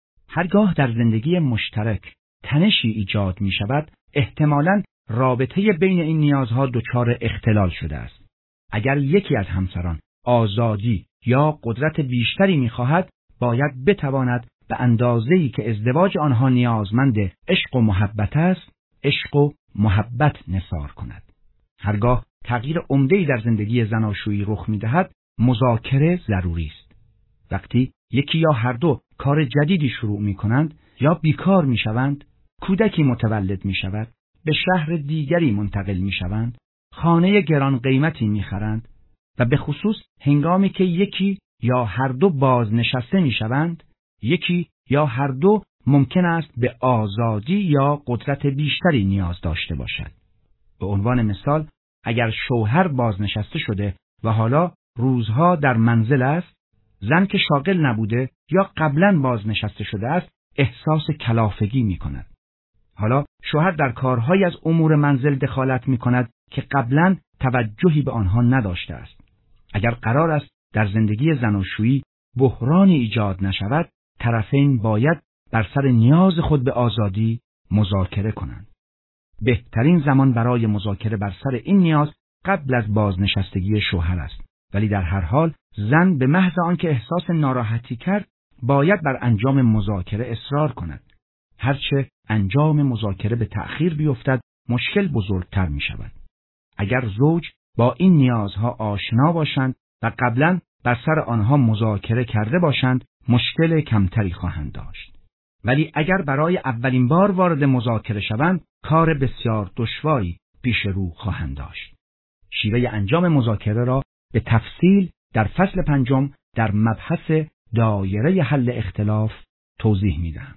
هرگاه در زندگی مشترک تنشی ایجاد می شود، احتمالاً رابطه بین این نیازها دچار اختلال شده است. اگر یکی از همسران آزادی یا قدرت بیشتری می خواهد، باید بتواند به اندازه‌ای که ازدواج آنها نیازمند عشق و محبت است، عشق و محبت نثار کند. هرگاه تغییر عمده‌ای در زندگی زناشویی رخ می‌دهد، مذاکره ضروری است. وقتی یکی یا هر دو کار جدیدی شروع می‌کنند یا بیکار می‌شوند، کودکی متولد می‌شود، به شهر دیگری منتقل می‌شوند، خانه گران قیمتی می‌خرند و به خصوص هنگامی که یکی یا هر دو بازنشسته می‌شوند، یکی یا هر دو ممکن است به آزادی یا قدرت بیشتری نیاز داشته باشد. به عنوان مثال، اگر شوهر بازنشسته شده و حالا روزها در منزل است، زن که شاغل نبوده یا قبلاً بازنشسته شده است، احساس کلافگی می کند. حالا شوهر در کارهای از امور منزل دخالت می کند که قبلاً توجهی به آنها نداشته است. اگر قرار است در زندگی زناشویی بحرانی ایجاد نشود، طرفین باید بر سر نیاز خود به آزادی مذاکره کنند. بهترین زمان برای مذاکره بر سر این نیاز قبل از بازنشستگی شوهر است، ولی در هر حال زن به محض آنکه احساس ناراحتی کرد باید بر انجام مذاکره اصرار کند. هرچه انجام مذاکره به تأخیر بیفتد مشکل بزرگتر می شود. اگر زوج با این نیازها آشنا باشند و قبلا بر سر آنها مذاکره کرده باشند، مشکل کمتری خواهند داشت. ولی اگر برای اولین بار وارد مذاکره شوند، کار بسیار دشواری پیش رو خواهند داشت. شیوه انجام مذاکره را به تفصیل در فصل پنجم در مبحث دایره حل اختلاف توضیح میدهم.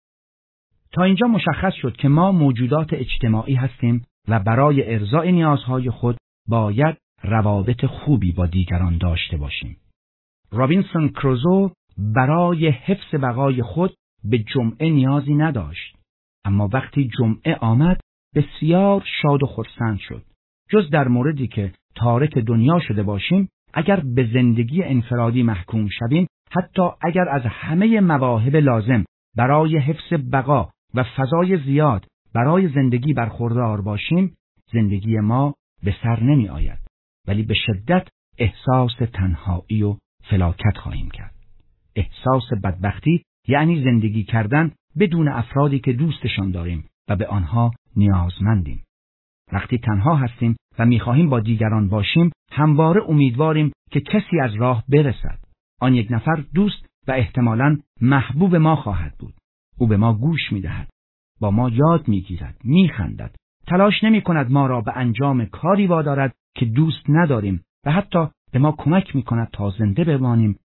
تا اینجا مشخص شد که ما موجودات اجتماعی هستیم و برای ارضاء نیازهای خود باید روابط خوبی با دیگران داشته باشیم. رابینسون کروزو برای حفظ بقای خود به جمعه نیازی نداشت، اما وقتی جمعه آمد بسیار شاد و خرسند شد. جز در موردی که تارک دنیا شده باشیم، اگر به زندگی انفرادی محکوم شویم، حتی اگر از همه مواهب لازم برای حفظ بقا و فضای زیاد برای زندگی برخوردار باشیم، زندگی ما به سر نمی آید، ولی به شدت احساس تنهایی و فلاکت خواهیم کرد. احساس بدبختی یعنی زندگی کردن بدون افرادی که دوستشان داریم و به آنها نیازمندیم. وقتی تنها هستیم و می‌خواهیم با دیگران باشیم، همواره امیدواریم که کسی از راه برسد. آن یک نفر دوست و احتمالاً محبوب ما خواهد بود. او به ما گوش می‌دهد، با ما یاد می‌گیرد، می‌خندد، تلاش نمی‌کند ما را به انجام کاری وادارد که دوست نداریم و حتی به ما کمک می‌کند تا زنده بمانیم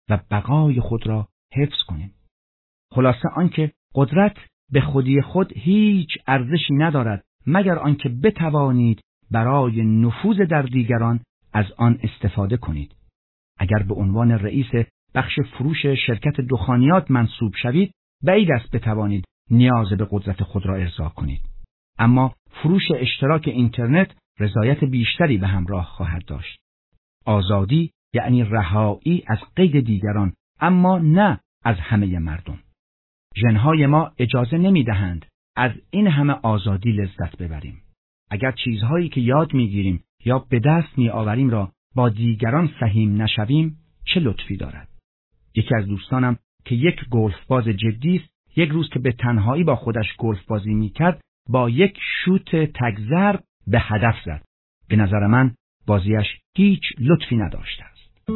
و بقای خود را حفظ کنیم. خلاصه آنکه قدرت به خودی خود هیچ ارزشی ندارد مگر آنکه بتوانید برای نفوذ در دیگران از آن استفاده کنید. اگر به عنوان رئیس بخش فروش شرکت دخانیات منصوب شوید، بعید است بتوانید نیاز به قدرت خود را ارضا کنید. اما فروش اشتراک اینترنت رضایت بیشتری به همراه خواهد داشت. آزادی یعنی رهایی از قید دیگران، اما نه از همه مردم. ژن‌های ما اجازه نمی‌دهند از این همه آزادی لذت ببریم. اگر چیزهایی که یاد می‌گیریم یا به دست می‌آوریم را با دیگران سهیم نشویم، چه لطفی دارد؟ یکی از دوستانم که یک گلف باز جدی است، یک روز که به تنهایی با خودش گلف بازی می‌کرد، با یک شوت تگ‌ضرب به هدف زد. به نظر من بازیش هیچ لطفی نداشته است.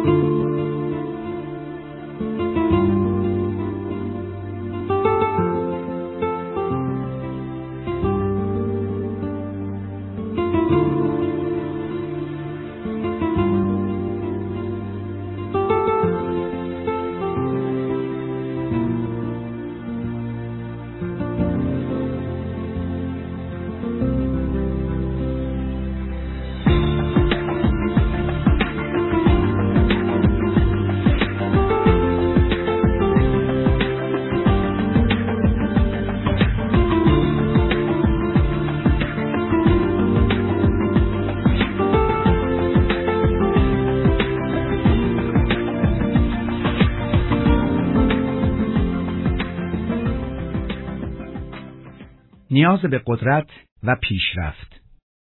نیاز به قدرت و پیشرفت.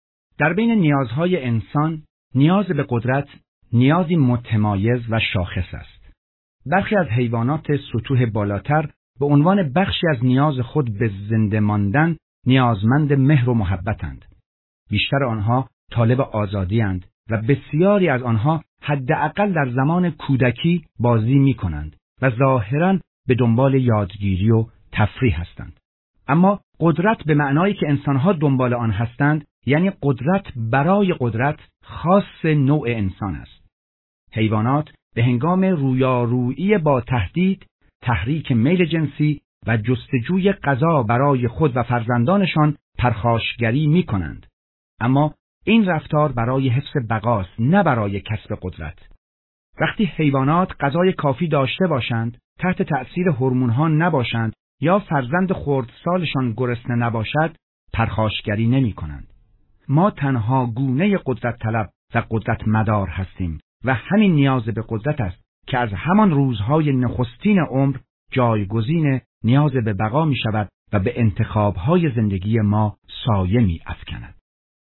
در بین نیازهای انسان، نیاز به قدرت نیازی متمایز و شاخص است. برخی از حیوانات سطوح بالاتر به عنوان بخشی از نیاز خود به زنده ماندن نیازمند مهر و محبتند. بیشتر آنها طالب آزادی‌اند و بسیاری از آنها حداقل در زمان کودکی بازی می‌کنند و ظاهراً به دنبال یادگیری و تفریح هستند. اما قدرت به معنایی که انسانها دنبال آن هستند، یعنی قدرت برای قدرت، خاص نوع انسان است. حیوانات به هنگام رویارویی با تهدید، تحریک میل جنسی و جستجوی غذا برای خود و فرزندانشان پرخاشگری می کنند. اما این رفتار برای حفظ بقاست، نه برای کسب قدرت. وقتی حیوانات غذای کافی داشته باشند، تحت تأثیر هورمون‌ها نباشند یا فرزند خردسالشان گرسنه نباشد، پرخاشگری نمی کنند. ما تنها گونه قدرت طلب و قدرت مدار هستیم و همین نیاز به قدرت است که از همان روزهای نخستین عمر جایگزین نیاز به بقا می شود و به انتخابهای زندگی ما سایه می افکند.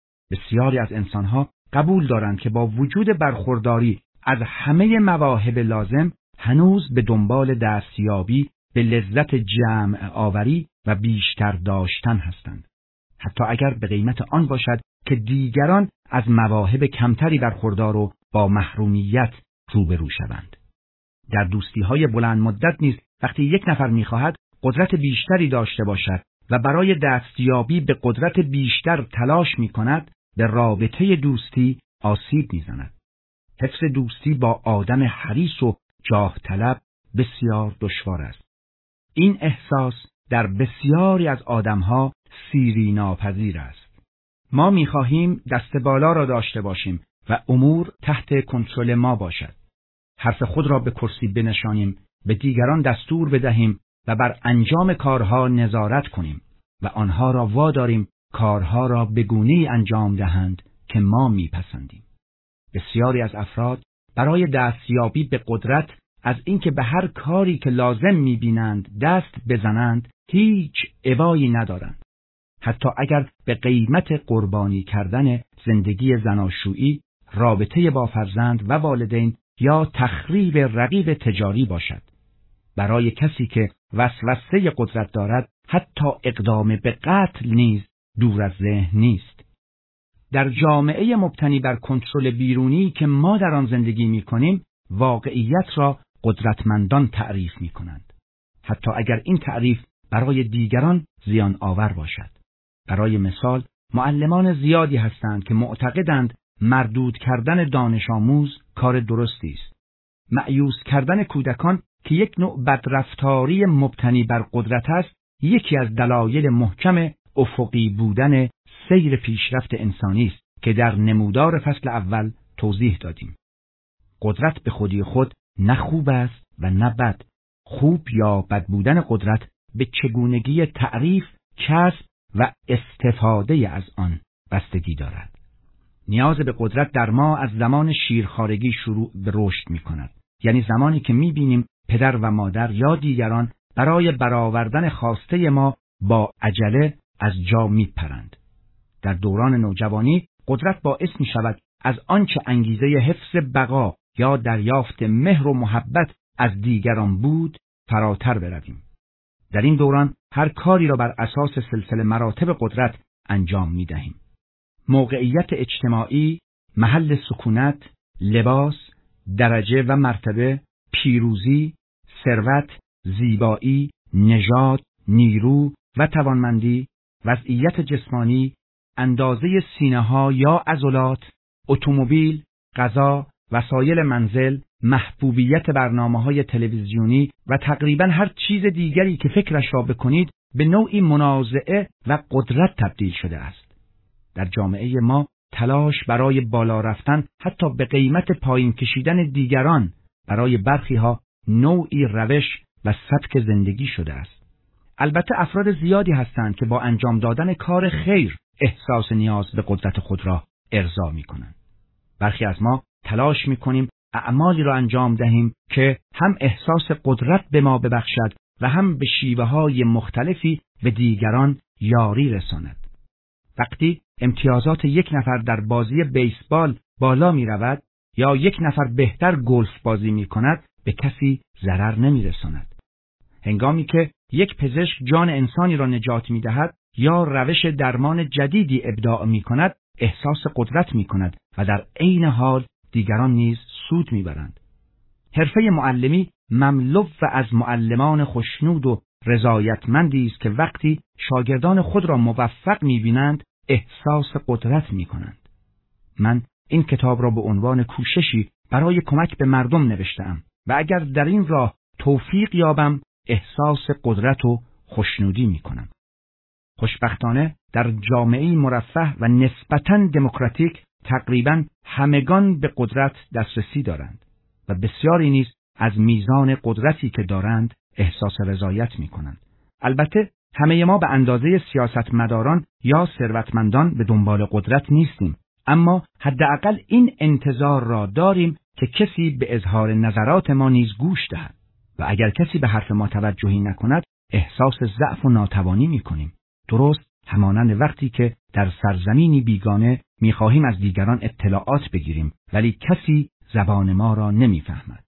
بسیاری از انسانها قبول دارند که با وجود برخورداری از همه مواهب لازم، هنوز به دنبال دستیابی به لذت جمع آوری و بیشتر داشتن هستند، حتی اگر به قیمت آن باشد که دیگران از مواهب کمتری برخوردار و با محرومیت روبرو شوند. در دوستی‌های بلند مدت نیز وقتی یک نفر می‌خواهد قدرت بیشتری داشته باشد و برای دستیابی به قدرت بیشتر تلاش می‌کند، به رابطه دوستی آسیب می‌زند. حفظ دوستی با آدم حریص و جاه طلب بسیار دشوار است. این احساس در بسیاری از آدمها سیری ناپذیر است. ما می‌خواهیم دست بالا را داشته باشیم و امور تحت کنترل ما باشد. حرف خود را به کرسی بنشانیم، به دیگران دستور بدهیم و بر انجام کارها نظارت کنیم و آنها را واداریم کارها را به گونه‌ای انجام دهند که ما میپسندیم. بسیاری از افراد برای دستیابی به قدرت از اینکه به هر کاری که لازم میبینند دست بزنند هیچ ابایی ندارند. حتی اگر به قیمت قربانی کردن زندگی زناشویی، رابطه با فرزند و والدین یا تخریب رقیب تجاری باشد. برای کسی که وسوسه قدرت دارد، حتی اقدام به قتل نیز دور از ذهن نیست. در جامعه مبتنی بر کنترل بیرونی که ما در آن زندگی می‌کنیم، واقعیت را قدرتمندان تعریف می‌کنند، حتی اگر این تعریف برای دیگران زیان آور باشد. برای مثال، معلمان زیادی هستند که معتقدند مردود کردن دانش آموز کار درستی است. مأیوس کردن کودکان که یک نوع بدرفتاری مبتنی بر قدرت است، یکی از دلایل محکم افقی بودن سیر پیشرفت انسانی است که در نمودار فصل اول توضیح دادیم. قدرت به خودی خود نه خوب است و نه بد. خوب یا بد بودن قدرت به چگونگی تعریف، کسب و استفاده از آن بستگی دارد. نیاز به قدرت در ما از زمان شیرخوارگی شروع به رشد می کند. یعنی زمانی که می بینیم پدر و مادر یا دیگران برای برآوردن خواسته ما با عجله از جا می پرند. در دوران نوجوانی قدرت باعث می شود از آنچه انگیزه حفظ بقا یا دریافت مهر و محبت از دیگران بود فراتر برویم. در این دوران هر کاری را بر اساس سلسله مراتب قدرت انجام می دهیم. موقعیت اجتماعی، محل سکونت، لباس، درجه و مرتبه، پیروزی، ثروت، زیبایی، نژاد، نیرو و توانمندی، وضعیت جسمانی، اندازه سینه‌ها یا عضلات، اتومبیل، غذا، وسایل منزل، محبوبیت برنامه‌های تلویزیونی و تقریباً هر چیز دیگری که فکرش را بکنید به نوعی منازعه و قدرت تبدیل شده است. در جامعه ما تلاش برای بالا رفتن حتی به قیمت پایین کشیدن دیگران برای برخی‌ها نوعی روش و سبک زندگی شده است. البته افراد زیادی هستند که با انجام دادن کار خیر احساس نیاز به قدرت خود را ارضا می‌کنند. برخی از ما تلاش می‌کنیم اعمالی را انجام دهیم که هم احساس قدرت به ما ببخشد و هم به شیوه‌های مختلفی به دیگران یاری رساند. وقتی امتیازات یک نفر در بازی بیسبال بالا می‌رود یا یک نفر بهتر گلف بازی می‌کند، به کسی ضرر نمی‌رساند. هنگامی که یک پزشک جان انسانی را نجات می‌دهد یا روش درمان جدیدی ابداع می‌کند، احساس قدرت می‌کند و در عین حال دیگران نیز سود می‌برند. حرفه معلمی مملو و از معلمان خوشنود و رضایتمندی است که وقتی شاگردان خود را موفق می‌بینند احساس قدرت می‌کنند. من این کتاب را به عنوان کوششی برای کمک به مردم نوشته‌ام و اگر در این راه توفیق یابم احساس قدرت و خوشنودی می‌کنم. خوشبختانه در جامعه‌ای مرفه و نسبتاً دموکراتیک تقریباً همگان به قدرت دسترسی دارند و بسیاری نیز از میزان قدرتی که دارند احساس رضایت می‌کنند. البته همه ما به اندازه سیاستمداران یا ثروتمندان به دنبال قدرت نیستیم، اما حداقل این انتظار را داریم که کسی به اظهار نظرات ما نیز گوش دهد و اگر کسی به حرف ما توجهی نکند احساس ضعف و ناتوانی می‌کنیم. درست همانند وقتی که در سرزمینی بیگانه می‌خواهیم از دیگران اطلاعات بگیریم ولی کسی زبان ما را نمی‌فهمد.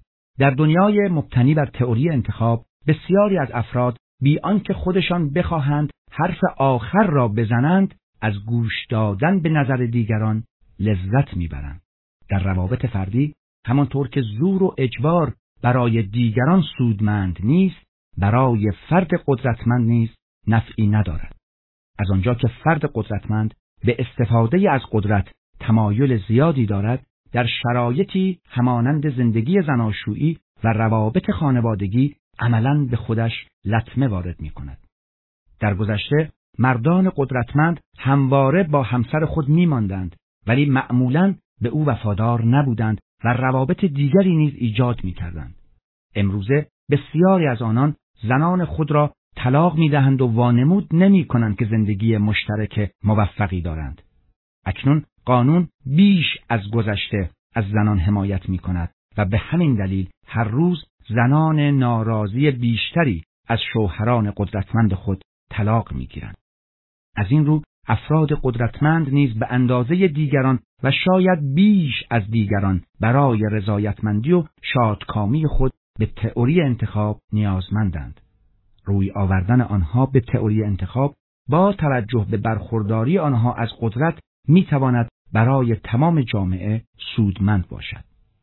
در دنیای مبتنی بر تئوری انتخاب بسیاری از افراد بی آنکه خودشان بخواهند حرف آخر را بزنند از گوش دادن به نظر دیگران لذت می‌برند. در روابط فردی همانطور که زور و اجبار برای دیگران سودمند نیست، برای فرد قدرتمند نیز نفعی ندارد. از آنجا که فرد قدرتمند به استفاده از قدرت تمایل زیادی دارد، در شرایطی همانند زندگی زناشویی و روابط خانوادگی عملاً به خودش لطمه وارد می کند. در گذشته مردان قدرتمند همواره با همسر خود می ماندند ولی معمولاً به او وفادار نبودند و روابط دیگری نیز ایجاد می کردند. امروزه بسیاری از آنان زنان خود را طلاق می دهند و وانمود نمی کنند که زندگی مشترک موفقی دارند. اکنون قانون بیش از گذشته از زنان حمایت می کند و به همین دلیل هر روز زنان ناراضی بیشتری از شوهران قدرتمند خود طلاق می گیرند. از این رو افراد قدرتمند نیز به اندازه دیگران و شاید بیش از دیگران برای رضایتمندی و شادکامی خود به تئوری انتخاب نیازمندند. روی آوردن آنها به تئوری انتخاب با توجه به برخورداری آنها از قدرت می تواند برای تمام جامعه سودمند باشد.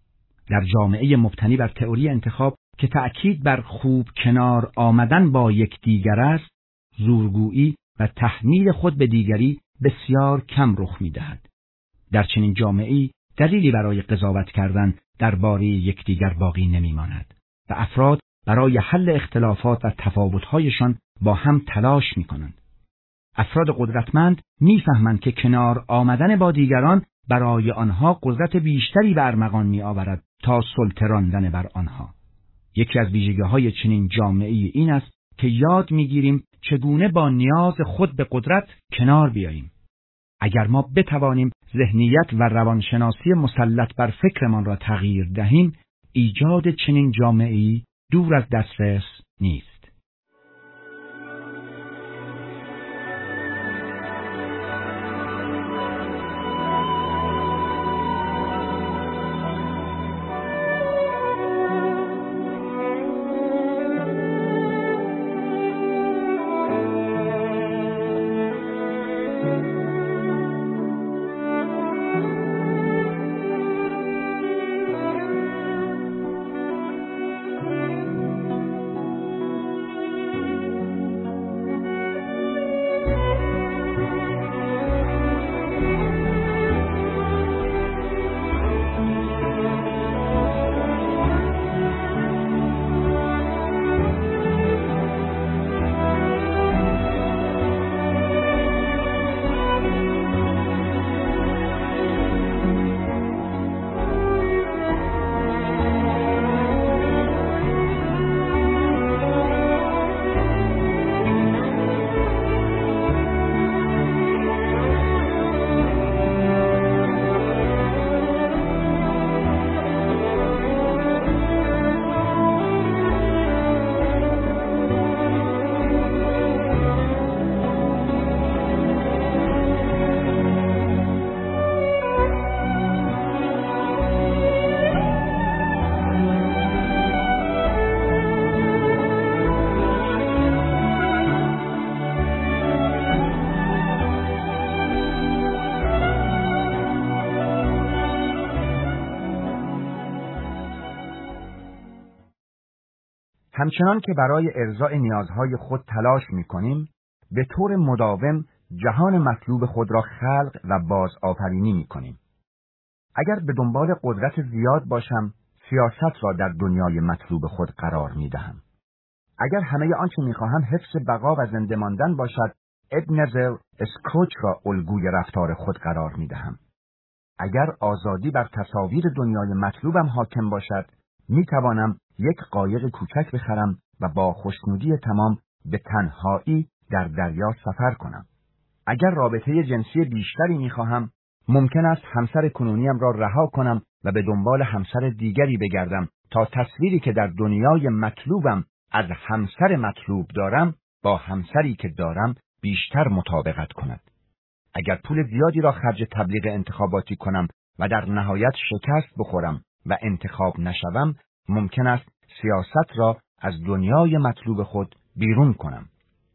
در جامعه مبتنی بر تئوری انتخاب که تأکید بر خوب کنار آمدن با یکدیگر است، زورگویی و تحمیل خود به دیگری بسیار کم رخ می دهد. در چنین جامعه‌ای دلیلی برای قضاوت کردن درباره یکدیگر باقی نمی‌ماند و افراد برای حل اختلافات و تفاوت‌هایشان با هم تلاش می‌کنند. افراد قدرتمند می‌فهمند که کنار آمدن با دیگران برای آنها قدرت بیشتری به ارمغان می‌آورد تا سلطه راندن بر آنها. یکی از ویژگی‌های چنین جامعه‌ای این است که یاد می‌گیریم چگونه با نیاز خود به قدرت کنار بیاییم. اگر ما بتوانیم ذهنیت و روانشناسی مسلط بر فکرمان را تغییر دهیم، ایجاد چنین جامعه‌ای دور از دسترس نیست. همچنان که برای ارضاء نیازهای خود تلاش می‌کنیم، به طور مداوم جهان مطلوب خود را خلق و بازآفرینی می‌کنیم. اگر به دنبال قدرت زیاد باشم، سیاست را در دنیای مطلوب خود قرار می‌دهم. اگر همه آنچه می‌خواهم حفظ بقا و زنده ماندن باشد، ابنزر اسکروچ را الگوی رفتار خود قرار می‌دهم. اگر آزادی بر تصاویر دنیای مطلوبم حاکم باشد، می‌توانم یک قایق کوچک بخرم و با خوشنودی تمام به تنهایی در دریا سفر کنم. اگر رابطه جنسی بیشتری می‌خواهم، ممکن است همسر کنونیم را رها کنم و به دنبال همسر دیگری بگردم تا تصویری که در دنیای مطلوبم از همسر مطلوب دارم با همسری که دارم بیشتر مطابقت کند. اگر پول زیادی را خرج تبلیغ انتخاباتی کنم و در نهایت شکست بخورم و انتخاب نشوم، ممکن است سیاست را از دنیای مطلوب خود بیرون کنم.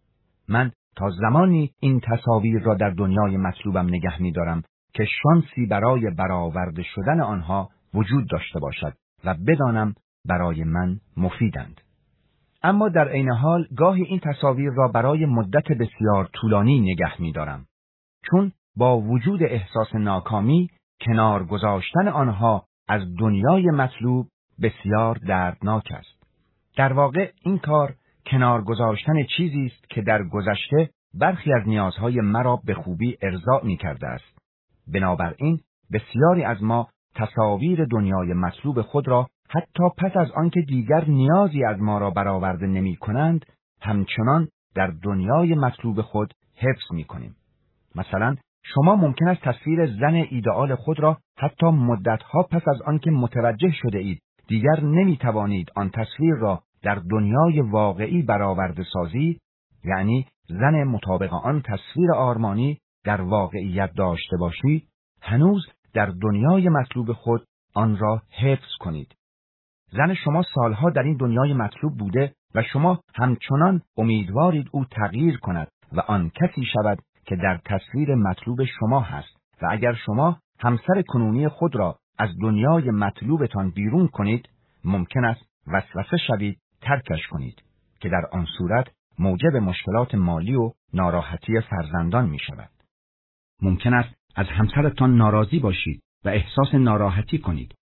من تا زمانی این تصاویر را در دنیای مطلوبم نگه می دارم که شانسی برای برآورده شدن آنها وجود داشته باشد و بدانم برای من مفیدند. اما در عین حال گاهی این تصاویر را برای مدت بسیار طولانی نگه می دارم، چون با وجود احساس ناکامی کنار گذاشتن آنها از دنیای مطلوب بسیار دردناک است. در واقع این کار کنار گذاشتن چیزی است که در گذشته برخی از نیازهای مرا به خوبی ارضا می کرده است. بنابراین بسیاری از ما تصاویر دنیای مطلوب خود را حتی پس از آنکه دیگر نیازی از ما را برآورده نمی کنند، همچنان در دنیای مطلوب خود حفظ می کنیم. مثلا شما ممکن است تصویر زن ایدئال خود را حتی مدتها پس از آنکه متوجه شده اید دیگر نمی توانید آن تصویر را در دنیای واقعی برآورده سازید، یعنی زن مطابق آن تصویر آرمانی در واقعیت داشته باشید، هنوز در دنیای مطلوب خود آن را حفظ کنید. زن شما سالها در این دنیای مطلوب بوده و شما همچنان امیدوارید او تغییر کند و آن کسی شود که در تصویر مطلوب شما هست. و اگر شما همسر کنونی خود را از دنیای مطلوبتان بیرون کنید، ممکن است وسوسه شوید ترکش کنید که در آن صورت موجب مشکلات مالی و ناراحتی فرزندان می شود. ممکن است از همسرتان ناراضی باشید و احساس ناراحتی کنید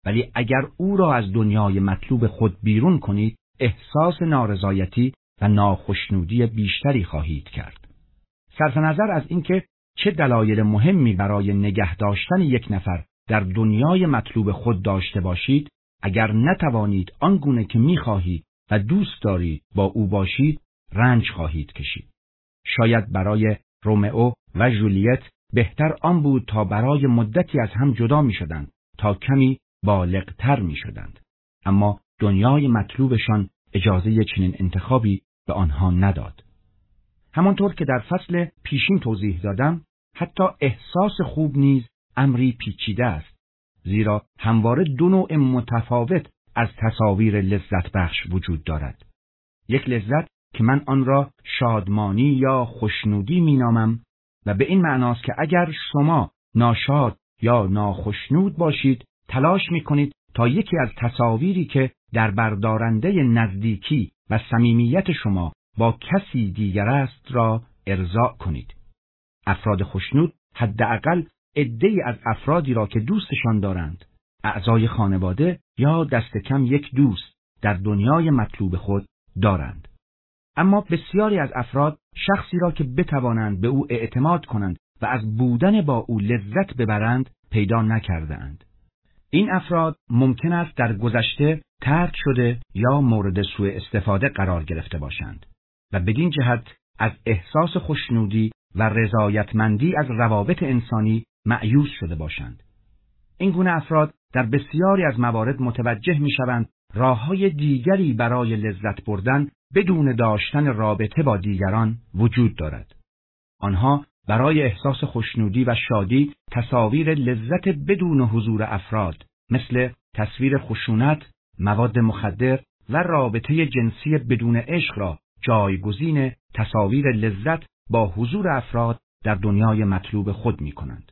ولی اگر او را از دنیای مطلوب خود بیرون کنید، احساس نارضایتی و ناخشنودی بیشتری خواهید کرد. صرف نظر از اینکه چه دلایل مهمی برای نگه داشتن یک نفر در دنیای مطلوب خود داشته باشید، اگر نتوانید آنگونه که می‌خواهید و دوست دارید با او باشید، رنج خواهید کشید. شاید برای رومئو و جولیت بهتر آن بود تا برای مدتی از هم جدا می‌شدند تا کمی بالغتر می‌شدند، اما دنیای مطلوبشان اجازه چنین انتخابی به آنها نداد. همانطور که در فصل پیشین توضیح دادم، حتی احساس خوب نیز امری پیچیده است، زیرا همواره دو نوع متفاوت از تصاویر لذت بخش وجود دارد. یک لذت که من آن را شادمانی یا خوشنودی مینامم و به این معناست که اگر شما ناشاد یا ناخشنود باشید، تلاش میکنید تا یکی از تصاویری که در بردارنده نزدیکی و صمیمیت شما با کسی دیگر است را ارضا کنید. افراد خوشنود حداقل عده‌ای از افرادی را که دوستشان دارند، اعضای خانواده یا دست کم یک دوست در دنیای مطلوب خود دارند. اما بسیاری از افراد شخصی را که بتوانند به او اعتماد کنند و از بودن با او لذت ببرند پیدا نکرده‌اند. این افراد ممکن است در گذشته طرد شده یا مورد سوء استفاده قرار گرفته باشند و بدین جهت از احساس خوشنودی و رضایتمندی از روابط انسانی مأیوس شده باشند. این گونه افراد در بسیاری از موارد متوجه می‌شوند راه‌های دیگری برای لذت بردن بدون داشتن رابطه با دیگران وجود دارد. آنها برای احساس خوشنودی و شادی تصاویر لذت بدون حضور افراد مثل تصویر خشونت، مواد مخدر و رابطه جنسی بدون عشق را جایگزین تصاویر لذت با حضور افراد در دنیای مطلوب خود می کنند.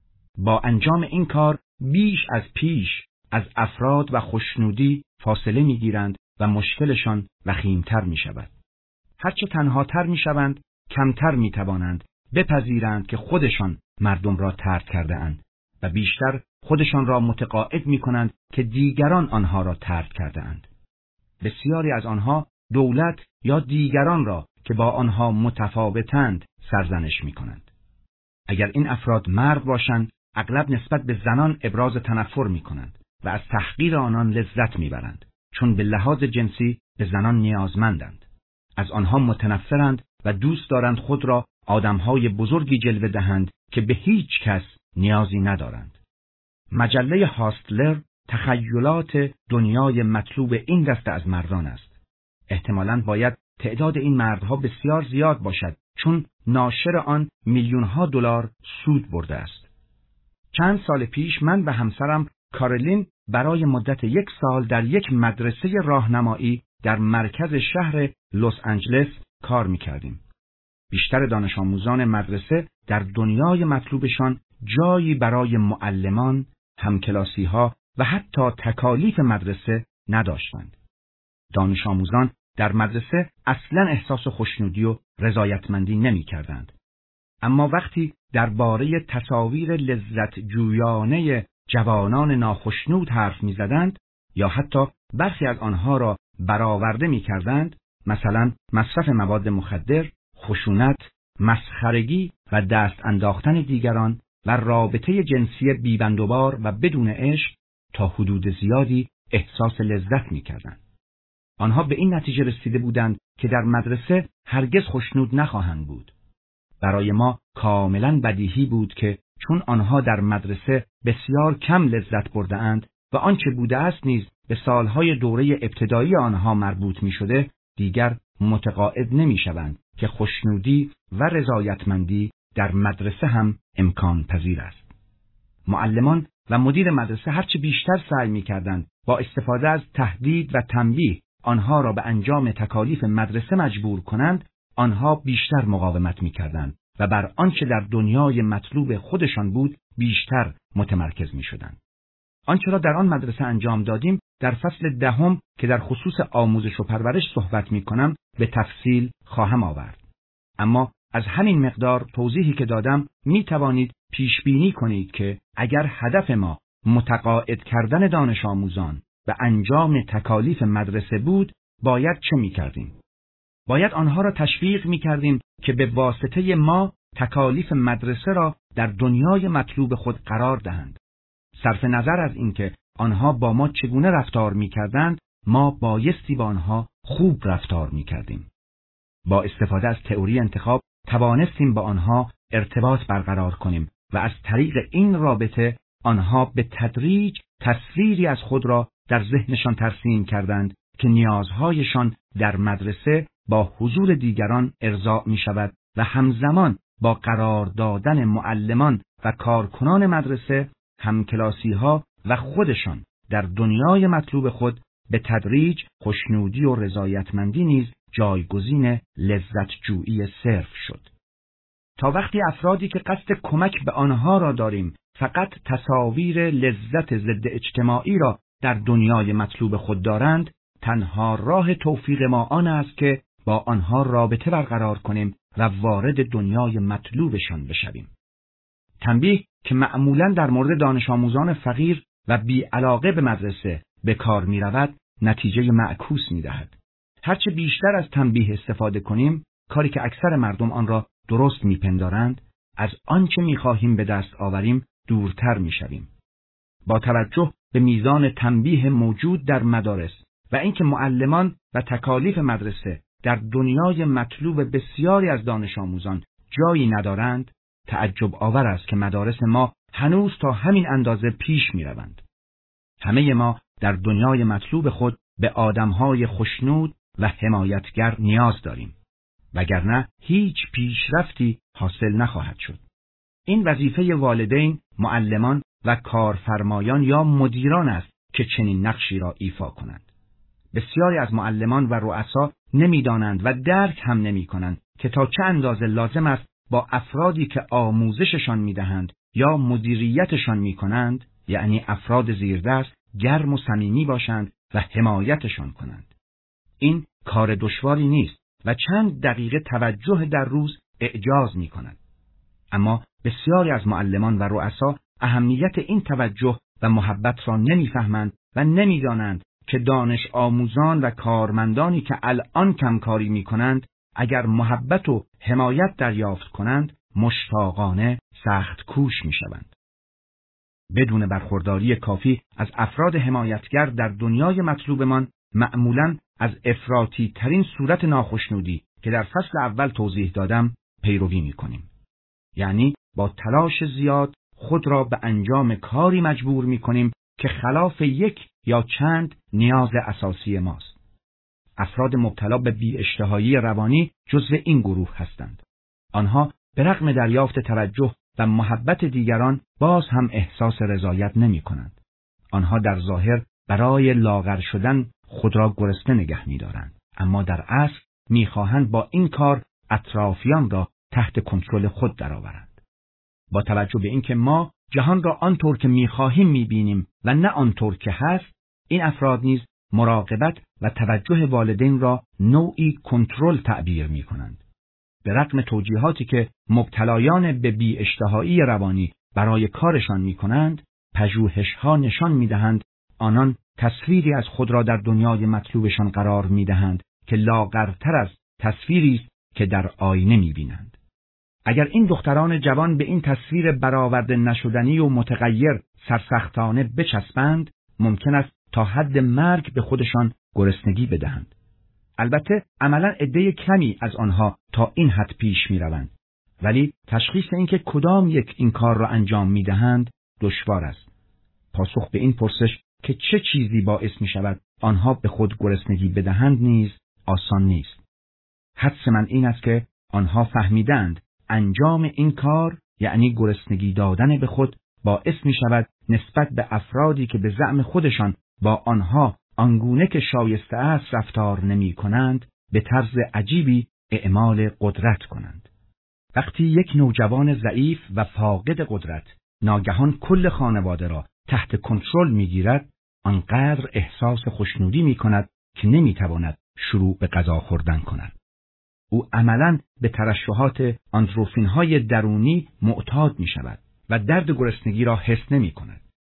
با انجام این کار بیش از پیش از افراد و خوشنودی فاصله می گیرند و مشکلشان وخیمتر می شود. هرچه تنهاتر می شوند، کمتر می توانند بپذیرند که خودشان مردم را طرد کرده اند و بیشتر خودشان را متقاعد می کنند که دیگران آنها را طرد کرده اند. بسیاری از آنها دولت یا دیگران را که با آنها متفاوتند سرزنش می کنند. اگر این افراد مرد باشند، اغلب نسبت به زنان ابراز تنفر می کنند و از تحقیر آنان لذت می برند، چون به لحاظ جنسی به زنان نیازمندند. از آنها متنفرند و دوست دارند خود را آدمهای بزرگی جلوه دهند که به هیچ کس نیازی ندارند. مجله هاستلر تخیلات دنیای مطلوب این دسته از مردان است. احتمالاً باید تعداد این مردها بسیار زیاد باشد، چون ناشر آن میلیون‌ها دلار سود برده است. چند سال پیش من و همسرم کارولین برای مدت یک سال در یک مدرسه راهنمایی در مرکز شهر لس آنجلس کار می‌کردیم. بیشتر دانش آموزان مدرسه در دنیای مطلوبشان جایی برای معلمان، همکلاسی‌ها و حتی تکالیف مدرسه نداشتند. دانش آموزان در مدرسه اصلاً احساس خوشنودی و رضایتمندی نمی‌کردند. اما وقتی درباره تصاویر لذت جویانه جوانان ناخشنود حرف می‌زدند یا حتی برخی از آنها را برآورده می‌کردند، مثلا مصرف مواد مخدر، خشونت، مسخرگی و دست انداختن دیگران و رابطه جنسی بیبندوبار و بدون عشق، تا حدود زیادی احساس لذت می‌کردند. آنها به این نتیجه رسیده بودند که در مدرسه هرگز خوشنود نخواهند بود. برای ما کاملا بدیهی بود که چون آنها در مدرسه بسیار کم لذت برده اند و آنچه بوده است نیز به سالهای دوره ابتدایی آنها مربوط می شده، دیگر متقاعد نمی شوند که خوشنودی و رضایتمندی در مدرسه هم امکان پذیر است. معلمان و مدیر مدرسه هرچه بیشتر سعی می کردند با استفاده از تهدید و تنبیه آنها را به انجام تکالیف مدرسه مجبور کنند، آنها بیشتر مقاومت می کردند و بر آنچه در دنیای مطلوب خودشان بود بیشتر متمرکز می شدند. آنچه را در آن مدرسه انجام دادیم در فصل دهم که در خصوص آموزش و پرورش صحبت می کنم به تفصیل خواهم آورد. اما از همین مقدار توضیحی که دادم می توانید پیش بینی کنید که اگر هدف ما متقاعد کردن دانش آموزان و انجام تکالیف مدرسه بود، باید چه می‌کردیم؟ باید آنها را تشویق می‌کردیم که به واسطه ما تکالیف مدرسه را در دنیای مطلوب خود قرار دهند. صرف نظر از اینکه آنها با ما چگونه رفتار می‌کردند، ما بایستی با آنها خوب رفتار می‌کردیم. با استفاده از تئوری انتخاب توانستیم با آنها ارتباط برقرار کنیم و از طریق این رابطه آنها به تدریج تصویری از خود را در ذهنشان ترسیم کردند که نیازهایشان در مدرسه با حضور دیگران ارضاء می شود و همزمان با قرار دادن معلمان و کارکنان مدرسه، همکلاسی‌ها و خودشان در دنیای مطلوب خود به تدریج خوشنودی و رضایتمندی نیز جایگزین لذت جویی صرف شد. تا وقتی افرادی که قصد کمک به آنها را داریم فقط تصاویر لذت ضد اجتماعی را در دنیای مطلوب خود دارند، تنها راه توفیق ما آن است که با آنها رابطه برقرار کنیم و وارد دنیای مطلوبشان بشویم. تنبیه که معمولاً در مورد دانش آموزان فقیر و بی علاقه به مدرسه به کار می رود، نتیجه معکوس می دهد. هرچه بیشتر از تنبیه استفاده کنیم، کاری که اکثر مردم آن را درست می پندارند، از آنچه می خواهیم به دست آوریم دورتر می شویم. با توجه به میزان تنبیه موجود در مدارس و اینکه معلمان و تکالیف مدرسه در دنیای مطلوب بسیاری از دانش آموزان جایی ندارند، تعجب آور است که مدارس ما هنوز تا همین اندازه پیش می روند. همه ما در دنیای مطلوب خود به آدمهای خوشنود و حمایتگر نیاز داریم، وگرنه هیچ پیشرفتی حاصل نخواهد شد. این وظیفه والدین، معلمان و کارفرمایان یا مدیران است که چنین نقشی را ایفا کنند. بسیاری از معلمان و رؤسا نمی‌دانند و درک هم نمی‌کنند که تا چه اندازه لازم است با افرادی که آموزششان می‌دهند یا مدیریتشان می‌کنند، یعنی افراد زیردست، گرم و صمیمی باشند و حمایتشان کنند. این کار دشواری نیست و چند دقیقه توجه در روز اعجاز می‌کند. اما بسیاری از معلمان و رؤسا اهمیت این توجه و محبت را نمی‌فهمند و نمی‌دانند که دانش آموزان و کارمندانی که الان کمکاری می‌کنند اگر محبت و حمایت دریافت کنند مشتاقانه سخت کوش می‌شوند. بدون برخورداری کافی از افراد حمایتگر در دنیای مطلوبمان معمولاً از افراطی ترین صورت ناخشنودی که در فصل اول توضیح دادم پیروی می‌کنیم. یعنی با تلاش زیاد خود را به انجام کاری مجبور می‌کنیم که خلاف یک یا چند نیاز اساسی ماست. افراد مبتلا به بی‌اشتهایی روانی جزو این گروه هستند. آنها به رغم دریافت توجه و محبت دیگران باز هم احساس رضایت نمی‌کنند. آنها در ظاهر برای لاغر شدن خود را گرسنه نگه می‌دارند، اما در اصل می‌خواهند با این کار اطرافیان را تحت کنترل خود درآورند. با توجه به اینکه ما جهان را آنطور که می‌خواهیم می‌بینیم و نه آنطور که هست، این افراد نیز مراقبت و توجه والدین را نوعی کنترل تعبیر می‌کنند. به رغم توجیهاتی که مبتلایان به بی‌اشتهایی روانی برای کارشان می‌کنند، پژوهش‌ها نشان می‌دهند آنان تصویری از خود را در دنیای مطلوبشان قرار می‌دهند که لاغرتر از تصویری است که در آینه می‌بینند. اگر این دختران جوان به این تصویر برآورده نشدنی و متغیر سرسختانه بچسبند، ممکن است تا حد مرگ به خودشان گرسنگی بدهند. البته عملاً عده کمی از آنها تا این حد پیش می‌روند، ولی تشخیص اینکه کدام یک این کار را انجام می‌دهند دشوار است. پاسخ به این پرسش که چه چیزی باعث می‌شود آنها به خود گرسنگی بدهند نیز آسان نیست. حدس من این است که آنها فهمیدند انجام این کار یعنی گرسنگی دادن به خود باعث می‌شود نسبت به افرادی که به زعم خودشان با آنها آنگونه که شایسته است رفتار نمی کنند به طرز عجیبی اعمال قدرت کنند. وقتی یک نوجوان ضعیف و فاقد قدرت ناگهان کل خانواده را تحت کنترل می گیرد، آنقدر احساس خوشنودی می کند که نمی تواند شروع به غذا خوردن کند. او عملاً به ترشحات اندروفین های درونی معتاد می شود و درد گرسنگی را حس نمی کند.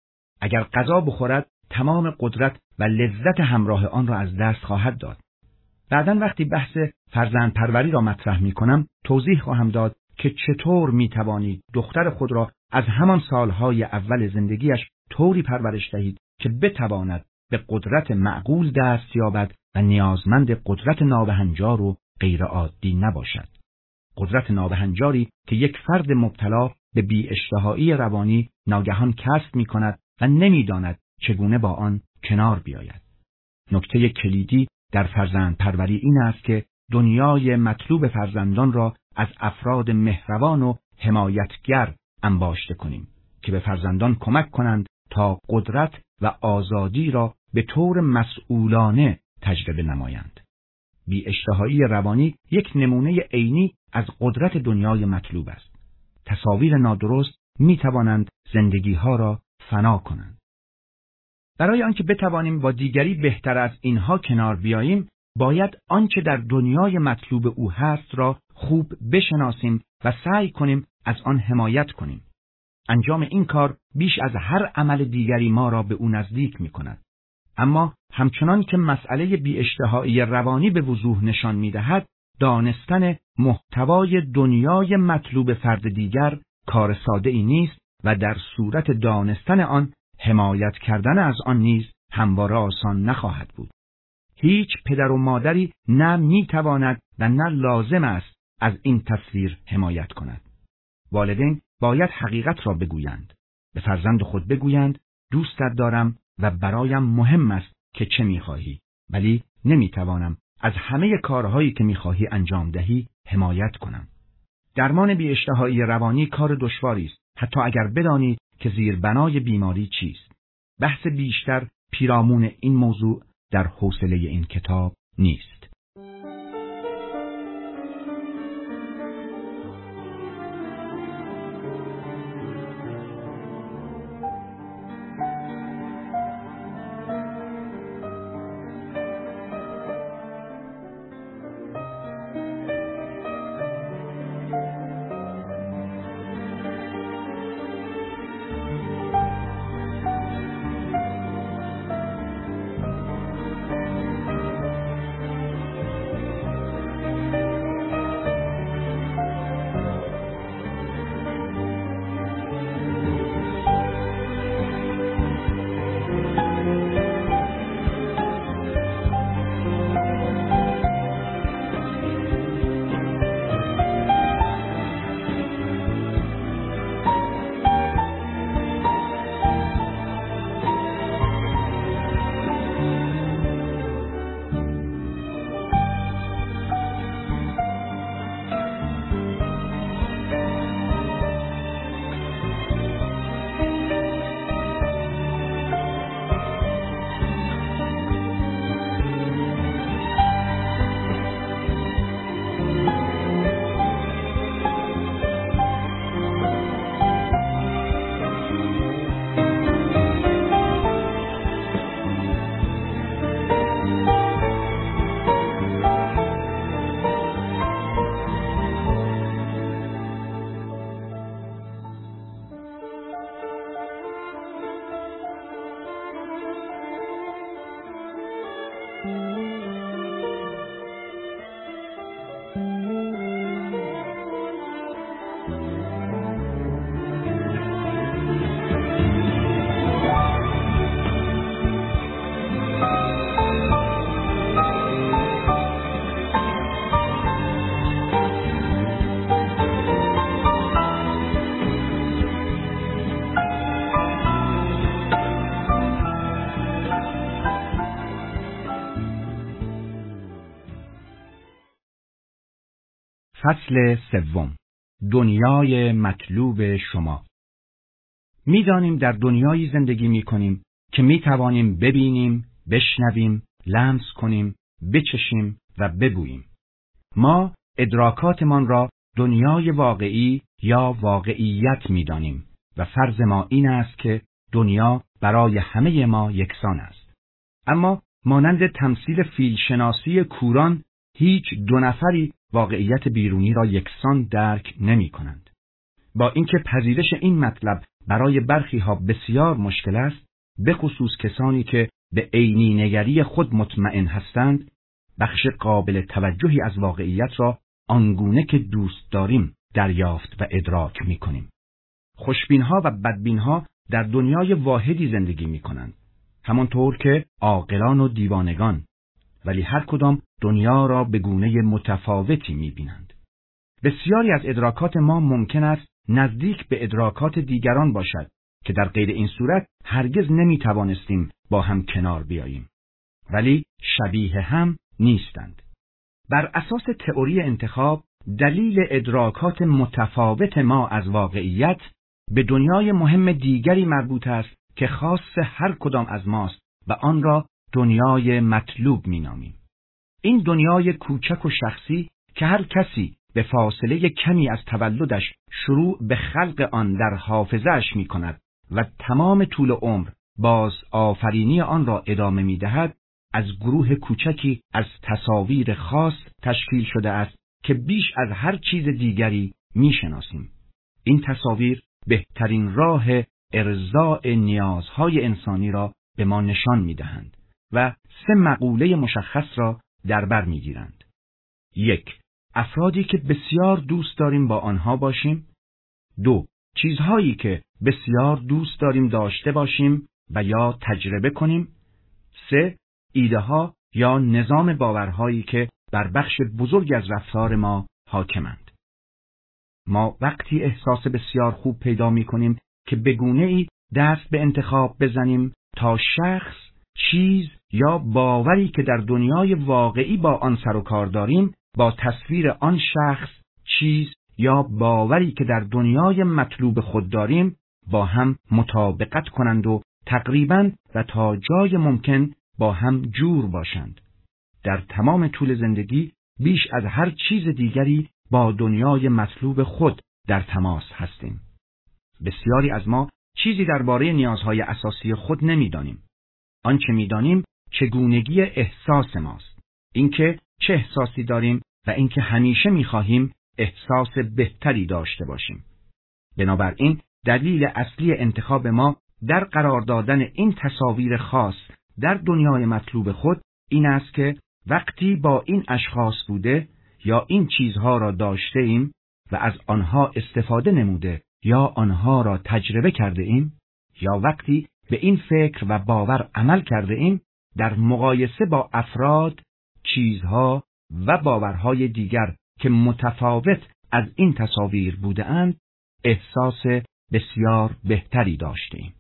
اگر غذا بخورد تمام قدرت و لذت همراه آن را از دست خواهد داد. بعداً وقتی بحث فرزند پروری را مطرح می کنم توضیح خواهم داد که چطور می توانید دختر خود را از همان سالهای اول زندگیش طوری پرورش دهید که بتواند به قدرت معقول دست یابد و نیازمند قدرت نابهنجار و غیر عادی نباشد. قدرت نابهنجاری که یک فرد مبتلا به بی‌اشتهایی روانی ناگهان کسب می کند و نمی داند چگونه با آن کنار بیاید. نکته کلیدی در فرزند پروری این است که دنیای مطلوب فرزندان را از افراد مهربان و حمایتگر انباشته کنیم که به فرزندان کمک کنند تا قدرت و آزادی را به طور مسئولانه تجربه نمایند. بی‌اشتهایی روانی یک نمونه عینی از قدرت دنیای مطلوب است. تصاویر نادرست می توانند زندگی‌ها را فنا کنند. برای آنکه بتوانیم با دیگری بهتر از اینها کنار بیاییم، باید آنچه در دنیای مطلوب او هست را خوب بشناسیم و سعی کنیم از آن حمایت کنیم. انجام این کار بیش از هر عمل دیگری ما را به او نزدیک می کند. اما همچنان که مسئله بی‌اشتهایی روانی به وضوح نشان می دهد، دانستن محتوای دنیای مطلوب فرد دیگر کار ساده ای نیست و در صورت دانستن آن حمایت کردن از آن نیز همواره آسان نخواهد بود. هیچ پدر و مادری نه می تواند و نه لازم است از این تصویر حمایت کند. والدین باید حقیقت را بگویند. به فرزند خود بگویند دوستت دارم و برایم مهم است که چه می خواهی، ولی نمی توانم از همه کارهایی که می خواهی انجام دهی حمایت کنم. درمان بی‌اشتهایی روانی کار دشواری است، حتی اگر بدانید که زیربنای بیماری چیست. بحث بیشتر پیرامون این موضوع در حوصله این کتاب نیست. فصل سوم. دنیای مطلوب شما. می‌دانیم در دنیایی زندگی می‌کنیم که می‌توانیم ببینیم، بشنویم، لمس کنیم، بچشیم و ببوییم. ما ادراکاتمان را دنیای واقعی یا واقعیت می‌دانیم و فرض ما این است که دنیا برای همه ما یکسان است. اما مانند تمثیل فیلشناسی کوران، هیچ دو نفری واقعیت بیرونی را یکسان درک نمی کنند. با اینکه پذیرش این مطلب برای برخی ها بسیار مشکل است، به خصوص کسانی که به عینی نگری خود مطمئن هستند، بخش قابل توجهی از واقعیت را آنگونه که دوست داریم دریافت و ادراک می کنیم. خوشبینها و بدبینها در دنیای واحدی زندگی می کنند، همانطور که عاقلان و دیوانگان، ولی هر کدام دنیا را به گونه متفاوتی می بینند. بسیاری از ادراکات ما ممکن است نزدیک به ادراکات دیگران باشد که در غیر این صورت هرگز نمی توانستیم با هم کنار بیاییم، ولی شبیه هم نیستند. بر اساس تئوری انتخاب، دلیل ادراکات متفاوت ما از واقعیت به دنیای مهم دیگری مربوط است که خاص هر کدام از ماست و آن را دنیای مطلوب می نامیم. این دنیای کوچک و شخصی که هر کسی به فاصله کمی از تولدش شروع به خلق آن در حافظه‌اش می کند و تمام طول عمر باز آفرینی آن را ادامه می دهد، از گروه کوچکی از تصاویر خاص تشکیل شده است که بیش از هر چیز دیگری می شناسیم. این تصاویر بهترین راه ارضاء نیازهای انسانی را به ما نشان می دهند و سه مقوله مشخص را در بر می گیرند. یک، افرادی که بسیار دوست داریم با آنها باشیم. دو، چیزهایی که بسیار دوست داریم داشته باشیم و یا تجربه کنیم. سه، ایده ها یا نظام باورهایی که بر بخش بزرگ از رفتار ما حاکمند. ما وقتی احساس بسیار خوب پیدا می کنیم که به گونه ای دست به انتخاب بزنیم تا شخص، چیز یا باوری که در دنیای واقعی با آن سر و کار داریم با تصویر آن شخص، چیز یا باوری که در دنیای مطلوب خود داریم با هم مطابقت کنند و تقریباً و تا جای ممکن با هم جور باشند. در تمام طول زندگی بیش از هر چیز دیگری با دنیای مطلوب خود در تماس هستیم. بسیاری از ما چیزی درباره نیازهای اساسی خود نمی‌دانیم. آنچه می‌دانیم چگونگی احساس ماست، اینکه چه احساسی داریم و اینکه همیشه می‌خواهیم احساس بهتری داشته باشیم. بنابراین دلیل اصلی انتخاب ما در قرار دادن این تصاویر خاص در دنیای مطلوب خود این است که وقتی با این اشخاص بوده یا این چیزها را داشته ایم و از آنها استفاده نموده یا آنها را تجربه کرده ایم یا وقتی به این فکر و باور عمل کرده ایم، در مقایسه با افراد، چیزها و باورهای دیگر که متفاوت از این تصاویر بوده اند، احساس بسیار بهتری داشته ایم.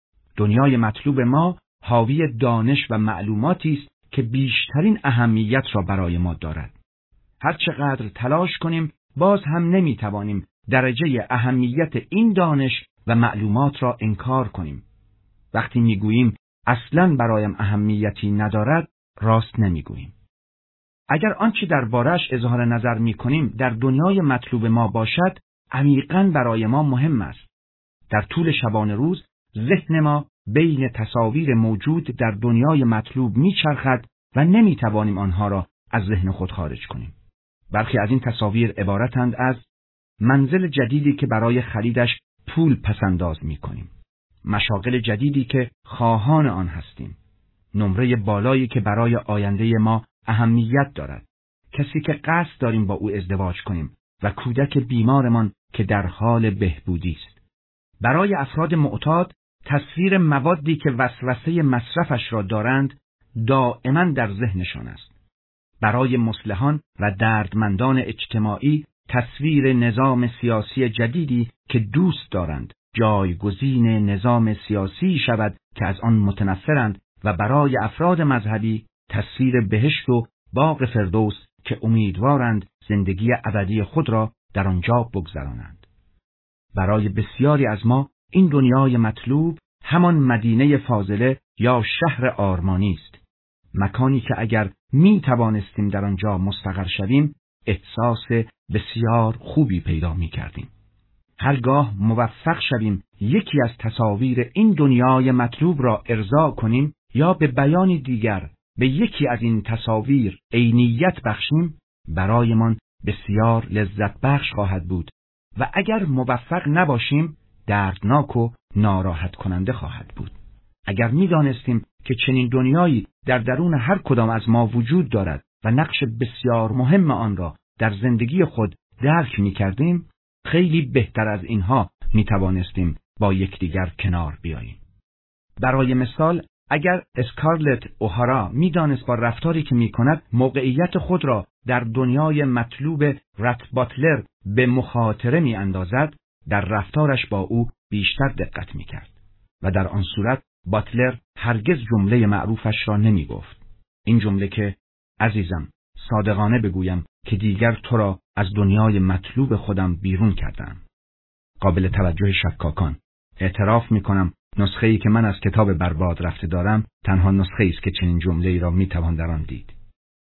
دنیای مطلوب ما حاوی دانش و معلوماتی است که بیشترین اهمیت را برای ما دارد. هر چقدر تلاش کنیم باز هم نمی توانیم درجه اهمیت این دانش و معلومات را انکار کنیم. وقتی می گوییم اصلاً برایم اهمیتی ندارد، راست نمی گوییم. اگر آنچه درباره‌اش اظهار نظر می کنیم در دنیای مطلوب ما باشد، عمیقاً برای ما مهم است. در طول شبانه روز ذهن ما بین تصاویر موجود در دنیای مطلوب می چرخد و نمی توانیم آنها را از ذهن خود خارج کنیم. برخی از این تصاویر عبارتند از منزل جدیدی که برای خریدش پول پسنداز می کنیم، مشاغل جدیدی که خواهان آن هستیم، نمره بالایی که برای آینده ما اهمیت دارد، کسی که قصد داریم با او ازدواج کنیم و کودک بیمارمان که در حال بهبودی است. برای افراد معتاد تصویر موادی که وسوسه مصرفش را دارند دائما در ذهنشان است. برای مصلحان و دردمندان اجتماعی تصویر نظام سیاسی جدیدی که دوست دارند جایگزین نظام سیاسی شود که از آن متنفرند، و برای افراد مذهبی تصویر بهشت و باغ فردوس که امیدوارند زندگی ابدی خود را در آنجا بگذرانند. برای بسیاری از ما این دنیای مطلوب همان مدینه فاضله یا شهر آرمانی است، مکانی که اگر می توانستیم در آنجا مستقر شویم احساس بسیار خوبی پیدا می کردیم. هرگاه موفق شویم یکی از تصاویر این دنیای مطلوب را ارضا کنیم یا به بیانی دیگر به یکی از این تصاویر عینیت بخشیم، برایمان بسیار لذت بخش خواهد بود و اگر موفق نباشیم دردناک و ناراحت کننده خواهد بود. اگر می‌دانستیم که چنین دنیایی در درون هر کدام از ما وجود دارد و نقش بسیار مهم آن را در زندگی خود درک می‌کردیم، خیلی بهتر از اینها می‌توانستیم با یکدیگر کنار بیاییم. برای مثال، اگر اسکارلت اوهارا می‌دانست با رفتاری که می‌کند موقعیت خود را در دنیای مطلوب رت باتلر به مخاطره می‌اندازد، در رفتارش با او بیشتر دقت می‌کرد و در آن صورت باتلر هرگز جمله معروفش را نمی‌گفت. این جمله که عزیزم، صادقانه بگویم که دیگر تو را از دنیای مطلوب خودم بیرون کردم. قابل توجه شکاکان، اعتراف می‌کنم نسخه‌ای که من از کتاب برباد رفته دارم تنها نسخه‌ای است که چنین جمله‌ای را می‌توان در آن دید.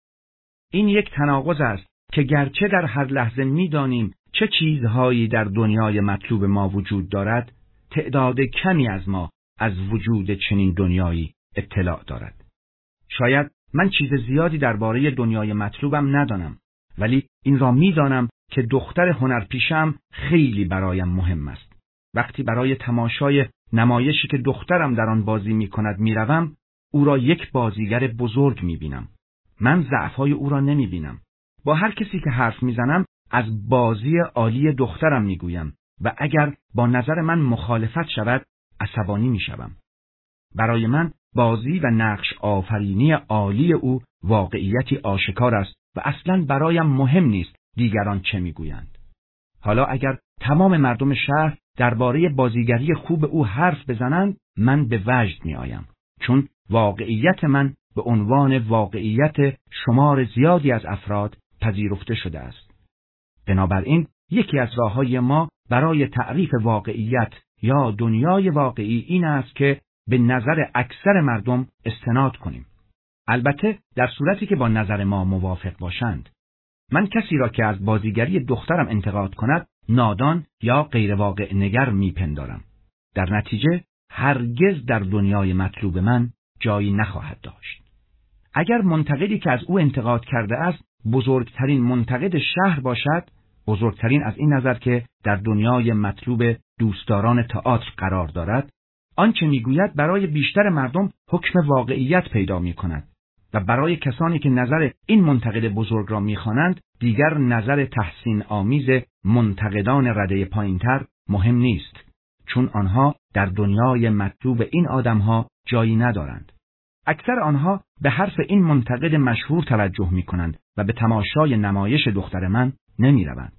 این یک تناقض است که گرچه در هر لحظه می‌دانیم چه چیزهایی در دنیای مطلوب ما وجود دارد، تعداد کمی از ما از وجود چنین دنیایی اطلاع دارد. شاید من چیز زیادی درباره دنیای مطلوبم ندانم، ولی این را می‌دانم که دختر هنرپیشم خیلی برایم مهم است. وقتی برای تماشای نمایشی که دخترم در آن بازی می‌کند می‌روم، او را یک بازیگر بزرگ می‌بینم. من ضعف‌های او را نمی‌بینم. با هر کسی که حرف می‌زنم از بازی عالی دخترم می‌گویم و اگر با نظر من مخالفت شود عصبانی می‌شوم. برای من بازی و نقش آفرینی عالی او واقعیتی آشکار است و اصلاً برایم مهم نیست دیگران چه می‌گویند. حالا اگر تمام مردم شهر درباره بازیگری خوب او حرف بزنند، من به وجد می‌آیم، چون واقعیت من به عنوان واقعیت شمار زیادی از افراد پذیرفته شده است. بنابراین یکی از راه‌های ما برای تعریف واقعیت یا دنیای واقعی این است که به نظر اکثر مردم استناد کنیم. البته در صورتی که با نظر ما موافق باشند. من کسی را که از بازیگری دخترم انتقاد کند نادان یا غیر واقع نگر میپندارم. در نتیجه هرگز در دنیای مطلوب من جایی نخواهد داشت. اگر منتقدی که از او انتقاد کرده است بزرگترین منتقد شهر باشد، بزرگترین از این نظر که در دنیای مطلوب دوستداران تئاتر قرار دارد، آنچه میگوید برای بیشتر مردم حکم واقعیت پیدا میکند و برای کسانی که نظر این منتقد بزرگ را میخوانند دیگر نظر تحسین آمیز منتقدان رده پایینتر مهم نیست، چون آنها در دنیای مطلوب این آدمها جایی ندارند. اکثر آنها به حرف این منتقد مشهور توجه میکنند و به تماشای نمایش دختر من نمیروند.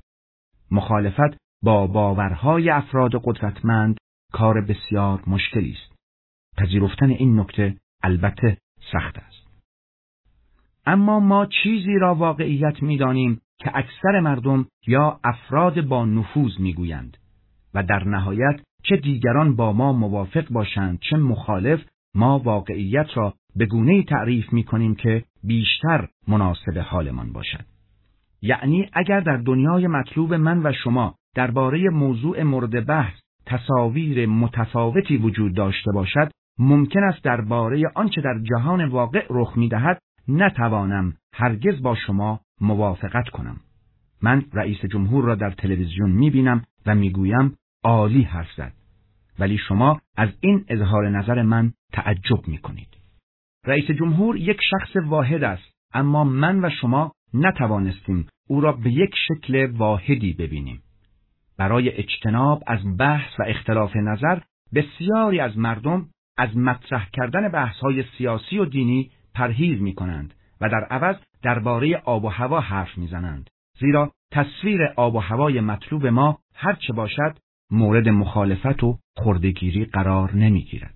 مخالفت با باورهای افراد قدرتمند کار بسیار مشکلی است. پذیرفتن این نکته البته سخت است. اما ما چیزی را واقعیت می‌دانیم که اکثر مردم یا افراد با نفوذ می‌گویند و در نهایت چه دیگران با ما موافق باشند چه مخالف، ما واقعیت را به گونه‌ای تعریف می‌کنیم که بیشتر مناسب حالمان باشد. یعنی اگر در دنیای مطلوب من و شما درباره موضوع مورد بحث تصاویر متفاوتی وجود داشته باشد، ممکن است درباره آنچه در جهان واقع رخ می‌دهد نتوانم هرگز با شما موافقت کنم. من رئیس جمهور را در تلویزیون می‌بینم و می‌گویم عالی حرف زد، ولی شما از این اظهار نظر من تعجب می‌کنید. رئیس جمهور یک شخص واحد است، اما من و شما نتوانستیم او را به یک شکل واحدی ببینیم. برای اجتناب از بحث و اختلاف نظر، بسیاری از مردم از مطرح کردن بحث‌های سیاسی و دینی پرهیز می‌کنند و در عوض درباره آب و هوا حرف می‌زنند، زیرا تصویر آب و هوای مطلوب ما هر چه باشد مورد مخالفت و خردگیری قرار نمی‌گیرد.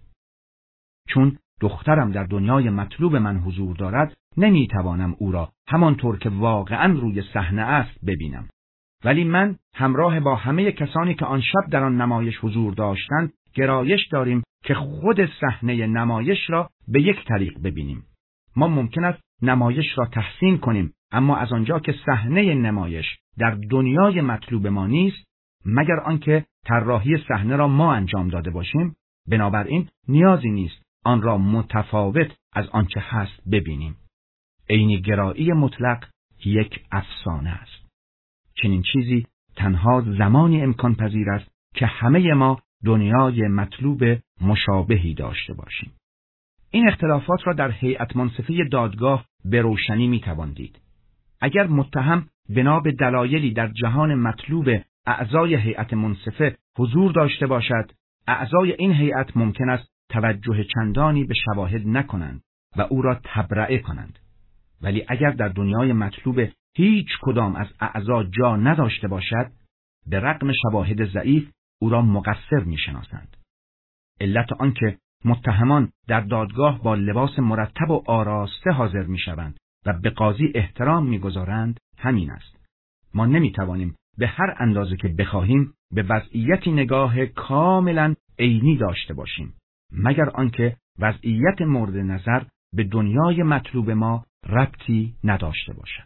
چون دخترم در دنیای مطلوب من حضور دارد، نمی‌توانم او را همانطور که واقعاً روی صحنه است ببینم. ولی من همراه با همه کسانی که آن شب در آن نمایش حضور داشتند گرایش داریم که خود صحنه نمایش را به یک طریق ببینیم. ما ممکن است نمایش را تحسین کنیم، اما از آنجا که صحنه نمایش در دنیای مطلوب ما نیست، مگر آنکه طراحی صحنه را ما انجام داده باشیم، بنابراین نیازی نیست آن را متفاوت از آنچه هست ببینیم. عینی‌گرایی مطلق یک افسانه است. چنین چیزی تنها زمانی امکان پذیر است که همه ما دنیای مطلوب مشابهی داشته باشیم. این اختلافات را در هیئت منصفه دادگاه به روشنی میتوان دید. اگر متهم بنا به دلایلی در جهان مطلوب اعضای هیئت منصفه حضور داشته باشد، اعضای این هیئت ممکن است توجه چندانی به شواهد نکنند و او را تبرئه کنند. ولی اگر در دنیای مطلوب هیچ کدام از اعضا جا نداشته باشد، به رغم شواهد ضعیف او را مقصر می‌شناسند. علت آنکه متهمان در دادگاه با لباس مرتب و آراسته حاضر می‌شوند و به قاضی احترام می‌گذارند همین است. ما نمی‌توانیم به هر اندازه که بخواهیم به وضعیتی نگاه کاملاً عینی داشته باشیم، مگر آنکه وضعیت مورد نظر به دنیای مطلوب ما ربطی نداشته باشد.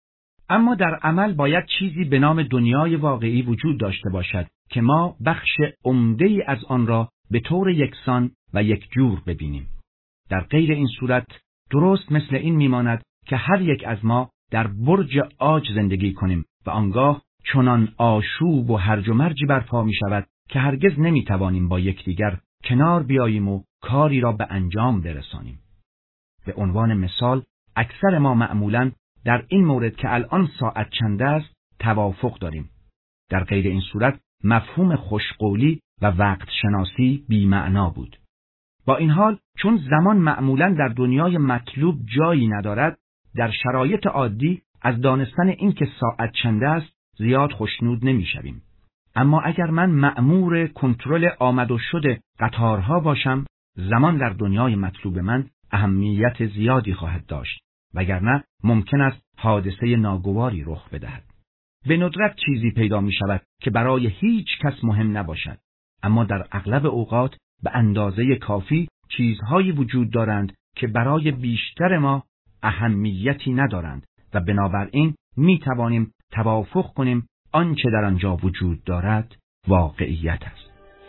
اما در عمل باید چیزی به نام دنیای واقعی وجود داشته باشد که ما بخش عمده‌ای از آن را به طور یکسان و یکجور ببینیم. در غیر این صورت درست مثل این میماند که هر یک از ما در برج عاج زندگی کنیم و آنگاه چنان آشوب و هرج و مرجی برپا می شود که هرگز نمی توانیم با یکدیگر کنار بیاییم و کاری را به انجام برسانیم. به عنوان مثال، اکثر ما معمولاً در این مورد که الان ساعت چند است توافق داریم. در غیر این صورت مفهوم خوشقولی و وقت شناسی بی معنا بود. با این حال چون زمان معمولاً در دنیای مطلوب جایی ندارد، در شرایط عادی از دانستن این که ساعت چند است زیاد خوشنود نمی شویم. اما اگر من مأمور کنترل آمد و شد قطارها باشم، زمان در دنیای مطلوب من اهمیت زیادی خواهد داشت، وگرنه ممکن است حادثه ناگواری رخ بدهد. به ندرت چیزی پیدا می شود که برای هیچ کس مهم نباشد، اما در اغلب اوقات به اندازه کافی چیزهایی وجود دارند که برای بیشتر ما اهمیتی ندارند و بنابراین می توانیم توافق کنیم آنچه در آنجا وجود دارد واقعیت است.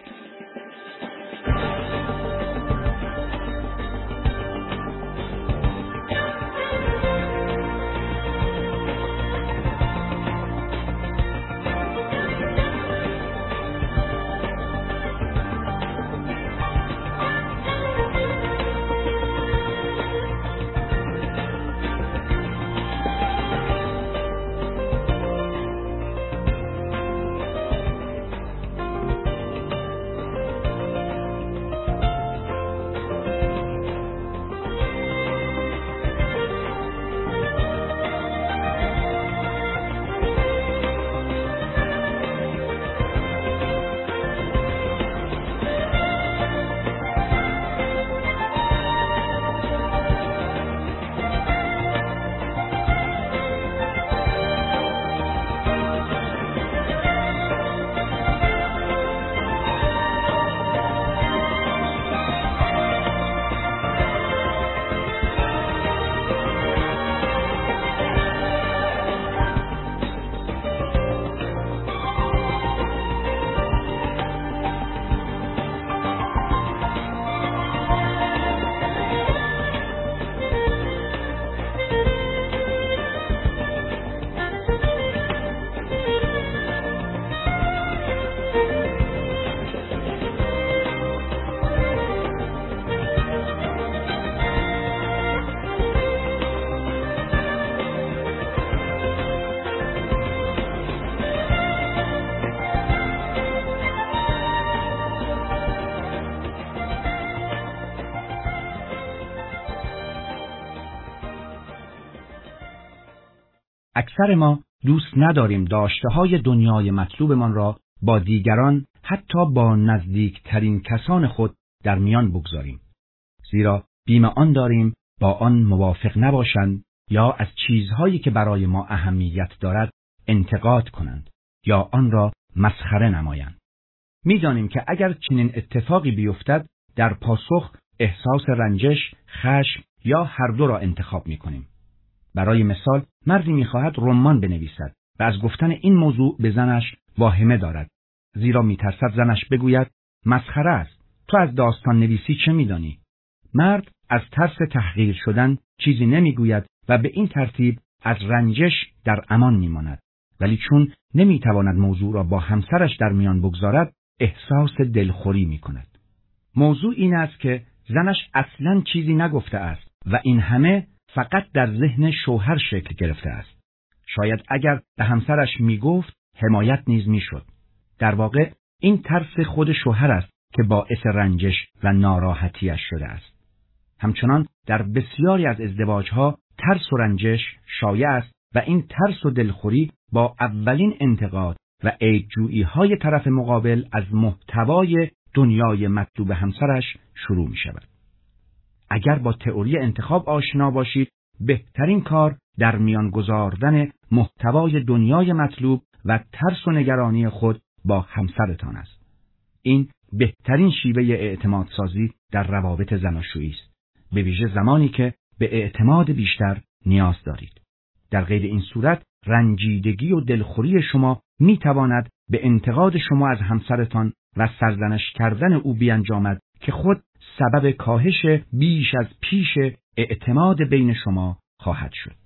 اکثر ما دوست نداریم داشته‌های دنیای مطلوبمان را با دیگران، حتی با نزدیکترین کسان خود در میان بگذاریم، زیرا بیم آن داریم با آن موافق نباشند یا از چیزهایی که برای ما اهمیت دارد انتقاد کنند یا آن را مسخره نمایند. می‌دانیم که اگر چنین اتفاقی بیفتد در پاسخ احساس رنجش، خشم یا هر دو را انتخاب می‌کنیم. برای مثال، مردی می‌خواهد رمان بنویسد و از گفتن این موضوع به زنش واهمه دارد، زیرا می‌ترسد زنش بگوید مسخره است، تو از داستان نویسی چه می‌دانی؟ مرد از ترس تحقیر شدن چیزی نمی‌گوید و به این ترتیب از رنجش در امان می‌ماند، ولی چون نمی‌تواند موضوع را با همسرش در میان بگذارد، احساس دلخوری می‌کند. موضوع این است که زنش اصلاً چیزی نگفته است و این همه فقط در ذهن شوهر شکل گرفته است. شاید اگر به همسرش میگفت حمایت نیز میشد. در واقع این ترس خود شوهر است که باعث رنجش و ناراحتیش شده است. همچنان در بسیاری از ازدواجها ترس و رنجش شایع است و این ترس و دلخوری با اولین انتقاد و عیب‌جویی‌های طرف مقابل از محتوای دنیای مطلوب همسرش شروع می شود. اگر با تئوری انتخاب آشنا باشید، بهترین کار در میان گذاردن محتوای دنیای مطلوب و ترس و نگرانی خود با همسرتان است. این بهترین شیوه اعتماد سازی در روابط زناشویی است، به ویژه زمانی که به اعتماد بیشتر نیاز دارید. در غیر این صورت رنجیدگی و دلخوری شما می تواند به انتقاد شما از همسرتان و سرزنش کردن او بیانجامد که خود سبب کاهش بیش از پیش اعتماد بین شما خواهد شد.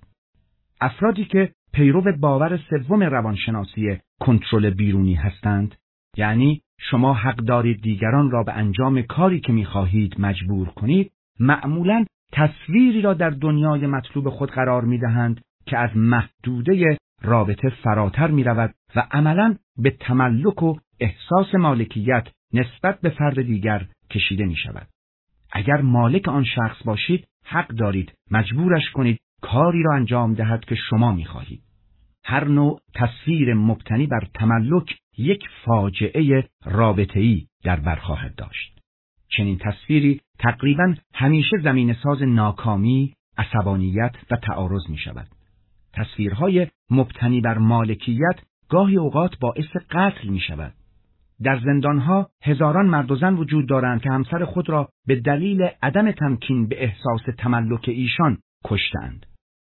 افرادی که پیرو باور سوم روانشناسی کنترل بیرونی هستند، یعنی شما حق دارید دیگران را به انجام کاری که می‌خواهید مجبور کنید، معمولاً تصویری را در دنیای مطلوب خود قرار می‌دهند که از محدوده رابطه فراتر می‌رود و عملاً به تملک و احساس مالکیت نسبت به فرد دیگر کشیده می‌شود. اگر مالک آن شخص باشید، حق دارید مجبورش کنید کاری را انجام دهد که شما می‌خواهید. هر نوع تصویر مبتنی بر تملک یک فاجعه رابطه‌ای در بر خواهد داشت. چنین تصویری تقریباً همیشه زمینه‌ساز ناکامی، عصبانیت و تعارض می‌شود. تصویرهای مبتنی بر مالکیت گاهی اوقات باعث قتل می‌شود. در زندانها هزاران مرد و زن وجود دارند که همسر خود را به دلیل عدم تمکین به احساس تملک ایشان کشتند.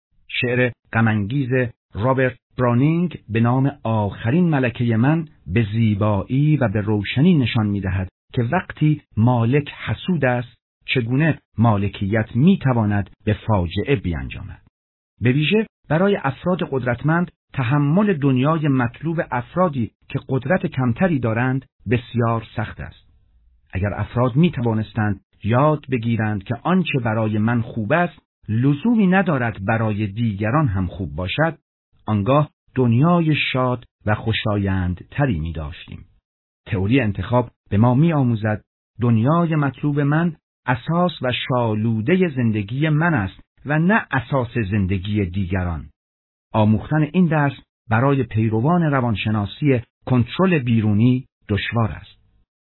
شعر غم‌انگیز رابرت برانینگ به نام آخرین ملکه من به زیبایی و به روشنی نشان می‌دهد که وقتی مالک حسود است، چگونه مالکیت می‌تواند به فاجعه بیانجامد. به ویژه برای افراد قدرتمند تحمل دنیای مطلوب افرادی که قدرت کمتری دارند بسیار سخت است. اگر افراد می توانستند یاد بگیرند که آنچه برای من خوب است لزومی ندارد برای دیگران هم خوب باشد، آنگاه دنیای شاد و خوشایند تری می داشتیم. تئوری انتخاب به ما می آموزد دنیای مطلوب من اساس و شالوده زندگی من است و نه اساس زندگی دیگران. آموختن این درس برای پیروان روانشناسی کنترل بیرونی دشوار است.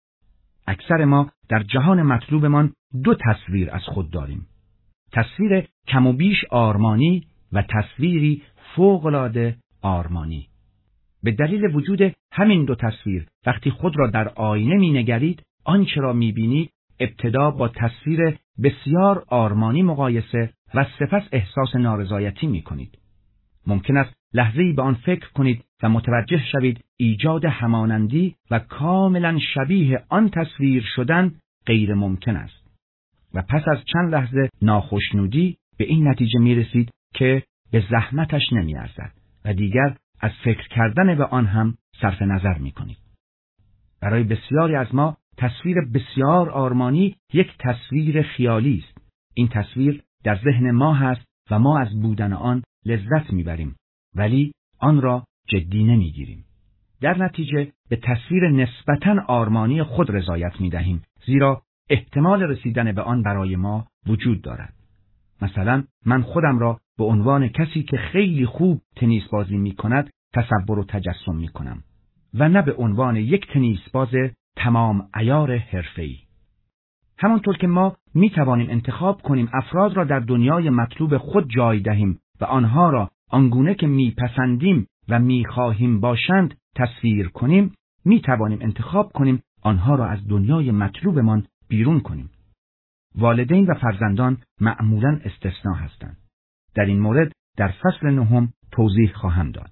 اکثر ما در جهان مطلوبمان دو تصویر از خود داریم. تصویر کم و بیش آرمانی و تصویری فوق‌العاده آرمانی. به دلیل وجود همین دو تصویر وقتی خود را در آینه می‌نگرید، آنچه را می‌بینید ابتدا با تصویر بسیار آرمانی مقایسه و سپس احساس نارضایتی می‌کنید. ممکن است لحظه‌ای به آن فکر کنید و متوجه شوید ایجاد همانندی و کاملا شبیه آن تصویر شدن غیر ممکن است. و پس از چند لحظه ناخوشنودی به این نتیجه می رسید که به زحمتش نمی ارزد و دیگر از فکر کردن به آن هم صرف نظر می کنید. برای بسیاری از ما تصویر بسیار آرمانی یک تصویر خیالی است. این تصویر در ذهن ما هست و ما از بودن آن لذت میبریم، ولی آن را جدی نمیگیریم. در نتیجه به تصویر نسبتاً آرمانی خود رضایت میدهیم، زیرا احتمال رسیدن به آن برای ما وجود دارد. مثلا من خودم را به عنوان کسی که خیلی خوب تنیس بازی میکند تصور و تجسم میکنم و نه به عنوان یک تنیس باز تمام عیار حرفه‌ای. همانطور که ما می توانیم انتخاب کنیم افراد را در دنیای مطلوب خود جای دهیم و آنها را آنگونه که می پسندیم و می خواهیم باشند تصویر کنیم، می توانیم انتخاب کنیم آنها را از دنیای مطلوبمان بیرون کنیم. والدین و فرزندان معمولاً استثناء هستند. در این مورد در فصل نهم توضیح خواهم داد.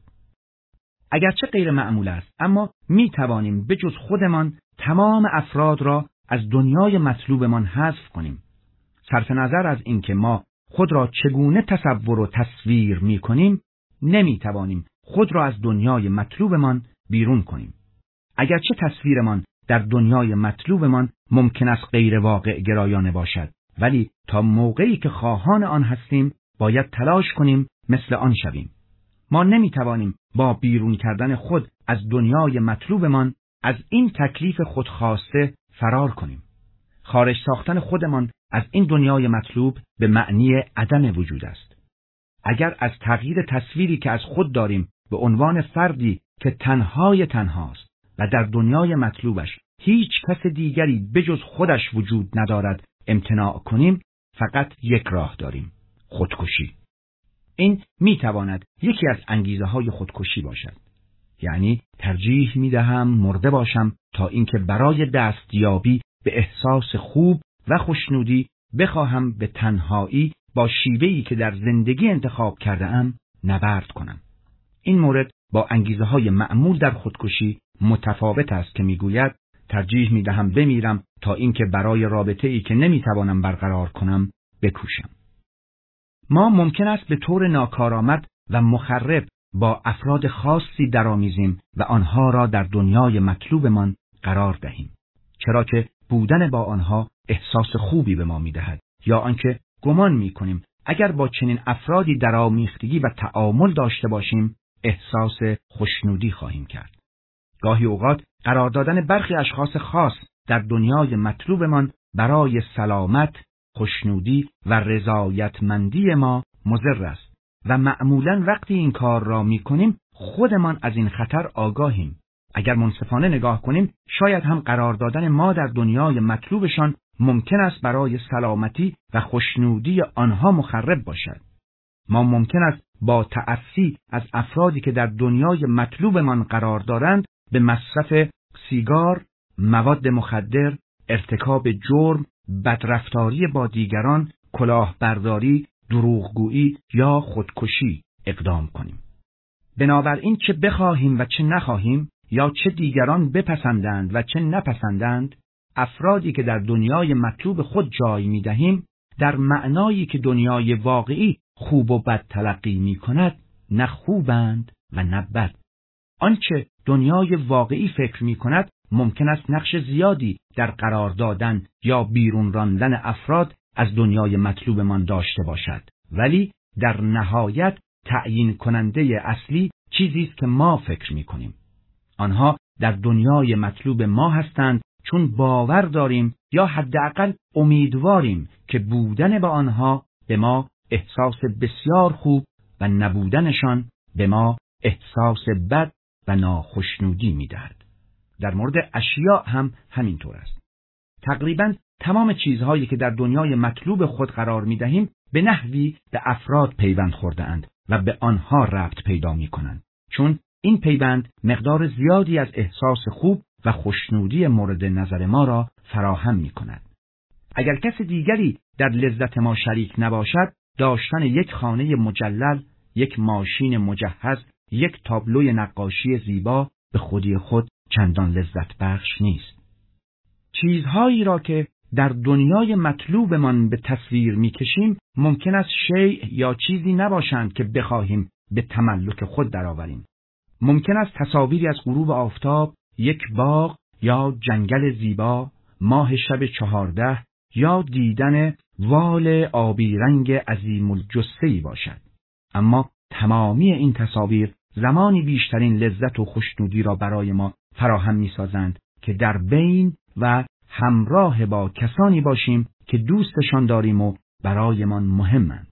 اگرچه غیر معمول است، اما می توانیم به جز خودمان تمام افراد را از دنیای مطلوبمان حذف کنیم. صرف نظر از اینکه ما خود را چگونه تصور و تصویر می کنیم، نمی توانیم خود را از دنیای مطلوبمان بیرون کنیم. اگرچه تصویرمان در دنیای مطلوبمان ممکن است غیر واقع گرایانه باشد، ولی تا موقعی که خواهان آن هستیم باید تلاش کنیم مثل آن شویم. ما نمیتوانیم با بیرون کردن خود از دنیای مطلوبمان از این تکلیف خودخواسته فرار کنیم. خارج ساختن خودمان از این دنیای مطلوب به معنی عدم وجود است. اگر از تغییر تصویری که از خود داریم به عنوان فردی که تنهای تنهاست و در دنیای مطلوبش هیچ کس دیگری بجز خودش وجود ندارد امتناع کنیم، فقط یک راه داریم: خودکشی. این میتواند یکی از انگیزه های خودکشی باشد. یعنی ترجیح میدهم مرده باشم تا اینکه برای دستیابی به احساس خوب و خوشنودی بخواهم به تنهایی با شیوهی که در زندگی انتخاب کرده ام نبرد کنم. این مورد با انگیزه های معمول در خودکشی متفاوت است که میگوید ترجیح میدهم بمیرم تا اینکه برای رابطه ای که نمیتوانم برقرار کنم بکوشم. ما ممکن است به طور ناکارآمد و مخرب با افراد خاصی درآمیزیم و آنها را در دنیای مطلوبمان قرار دهیم، چرا که بودن با آنها احساس خوبی به ما میدهد، یا آنکه گمان میکنیم اگر با چنین افرادی درآمیختگی و تعامل داشته باشیم احساس خوشنودی خواهیم کرد. گاهی اوقات قرار دادن برخی اشخاص خاص در دنیای مطلوبمان برای سلامت، خوشنودی و رضایتمندی ما مضر است و معمولاً وقتی این کار را میکنیم خودمان از این خطر آگاهیم. اگر منصفانه نگاه کنیم شاید هم قرار دادن ما در دنیای مطلوبشان ممکن است برای سلامتی و خوشنودی آنها مخرب باشد. ما ممکن است با تأسی از افرادی که در دنیای مطلوبمان قرار دارند به مصرف سیگار، مواد مخدر، ارتکاب جرم، بدرفتاری با دیگران، کلاهبرداری، دروغگویی یا خودکشی اقدام کنیم. بنابراین چه بخواهیم و چه نخواهیم، یا چه دیگران بپسندند و چه نپسندند، افرادی که در دنیای مطلوب خود جای می‌دهیم در معنایی که دنیای واقعی خوب و بد تلقی می‌کند نه خوبند و نه بد. آنچه دنیای واقعی فکر می‌کند ممکن است نقش زیادی در قرار دادن یا بیرون راندن افراد از دنیای مطلوبمان داشته باشد، ولی در نهایت تعیین کننده اصلی چیزی است که ما فکر می‌کنیم. آنها در دنیای مطلوب ما هستند چون باور داریم یا حداقل امیدواریم که بودن با آنها به ما احساس بسیار خوب و نبودنشان به ما احساس بد و ناخوشنودی می‌دهد. در مورد اشیاء هم همینطور است. تقریباً تمام چیزهایی که در دنیای مطلوب خود قرار می‌دهیم به نحوی به افراد پیوند خورده‌اند و به آنها ربط پیدا می‌کنند، چون این پیوند مقدار زیادی از احساس خوب و خوشنودی مورد نظر ما را فراهم می‌کند. اگر کس دیگری در لذت ما شریک نباشد، داشتن یک خانه مجلل، یک ماشین مجهز، یک تابلوی نقاشی زیبا به خودی خود چندان لذت بخش نیست. چیزهایی را که در دنیای مطلوبمان به تصویر می‌کشیم ممکن است شیء یا چیزی نباشند که بخواهیم به تملک خود درآوریم. ممکن است تصاویری از غروب آفتاب، یک باغ یا جنگل زیبا، ماه شب چهارده یا دیدن وال آبی رنگ عظیم الجثه‌ای باشد. اما تمامی این تصاویر زمانی بیشترین لذت و خوشنودی را برای ما فراهم می‌سازند که در بین و همراه با کسانی باشیم که دوستشان داریم و برایمان مهمند.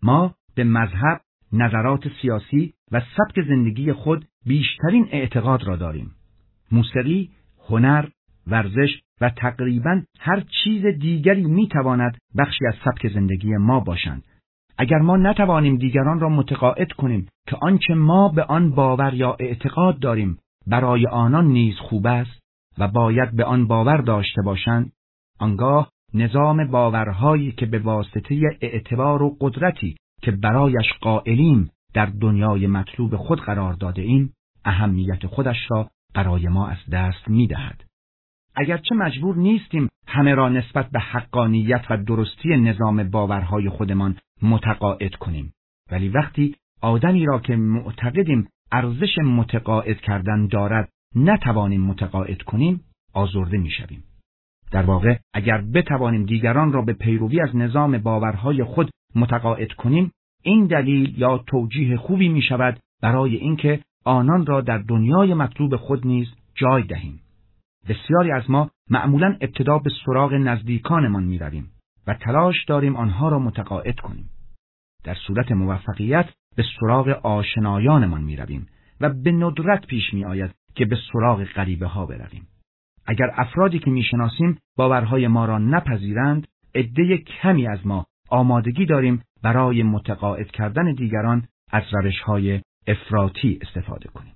ما به مذهب، نظرات سیاسی و سبک زندگی خود بیشترین اعتقاد را داریم. موسیقی، هنر، ورزش و تقریباً هر چیز دیگری میتواند بخشی از سبک زندگی ما باشند. اگر ما نتوانیم دیگران را متقاعد کنیم که آنچه ما به آن باور یا اعتقاد داریم برای آنان نیز خوب است و باید به آن باور داشته باشند، آنگاه نظام باورهایی که به واسطه اعتبار و قدرتی که برایش قائلیم در دنیای مطلوب خود قرار داده ایم، اهمیت خودش را برای ما از دست می‌دهد. اگرچه مجبور نیستیم همه را نسبت به حقانیت و درستی نظام باورهای خودمان متقاعد کنیم، ولی وقتی آدمی را که معتقدیم ارزش متقاعد کردن دارد نتوانیم متقاعد کنیم، آزرده می‌شویم. در واقع اگر بتوانیم دیگران را به پیروی از نظام باورهای خود متقاعد کنیم، این دلیل یا توجیه خوبی می‌شود برای اینکه آنان را در دنیای مطلوب خود نیز جای دهیم. بسیاری از ما معمولاً ابتدا به سراغ نزدیکانمان می‌رویم و تلاش داریم آنها را متقاعد کنیم. در صورت موفقیت به سراغ آشنایانمان می‌رویم و به ندرت پیش می‌آید که به سراغ غریبه‌ها برویم. اگر افرادی که می‌شناسیم باورهای ما را نپذیرند، عده کمی از ما آمادگی داریم برای متقاعد کردن دیگران از روش‌های افراطی استفاده کنیم.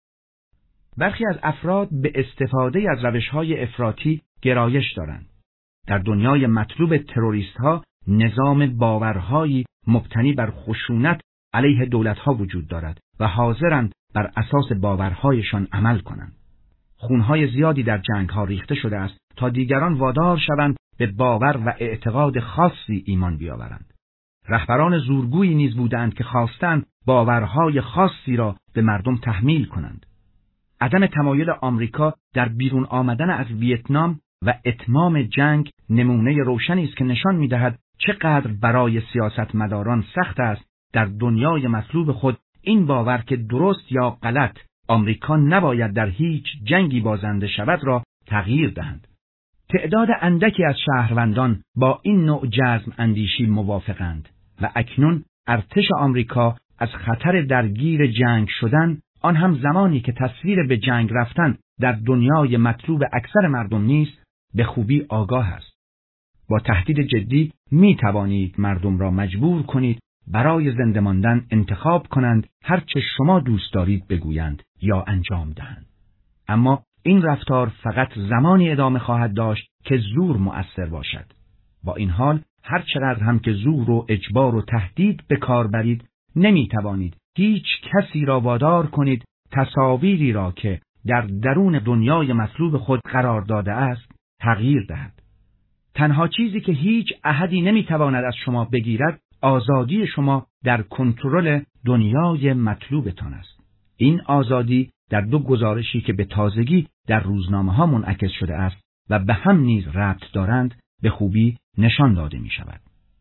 برخی از افراد به استفاده از روش‌های افراطی گرایش دارند. در دنیای مطلوب تروریست‌ها نظام باورهایی مبتنی بر خشونت علیه دولت‌ها وجود دارد و حاضرند بر اساس باورهایشان عمل کنند. خونهای زیادی در جنگ‌ها ریخته شده است تا دیگران وادار شوند به باور و اعتقاد خاصی ایمان بیاورند. رهبران زورگویی نیز بودند که خواستند باورهای خاصی را به مردم تحمیل کنند. عدم تمایل آمریکا در بیرون آمدن از ویتنام و اتمام جنگ نمونه روشنی است که نشان می‌دهد چقدر برای سیاستمداران سخت است در دنیای مطلوب خود این باور که درست یا غلط آمریکا نباید در هیچ جنگی بازنده شود را تغییر دهند. تعداد اندکی از شهروندان با این نوع جزم اندیشی موافقند و اکنون ارتش آمریکا از خطر درگیر جنگ شدن، آن هم زمانی که تصویر به جنگ رفتن در دنیای مطلوب اکثر مردم نیست، به خوبی آگاه است. با تهدید جدی می توانید مردم را مجبور کنید برای زنده ماندن انتخاب کنند هر چه شما دوست دارید بگویند یا انجام دهند. اما این رفتار فقط زمانی ادامه خواهد داشت که زور مؤثر باشد. با این حال هر چقدر هم که زور و اجبار و تهدید به کار برید، نمی توانید هیچ کسی را وادار کنید تصاویری را که در درون دنیای مطلوب خود قرار داده است تغییر دهد. تنها چیزی که هیچ احدی نمی تواند از شما بگیرد آزادی شما در کنترل دنیای مطلوبتان است. این آزادی در دو گزارشی که به تازگی در روزنامه ها منعکس شده است و به هم نیز ربط دارند به خوبی نشان داده می شود.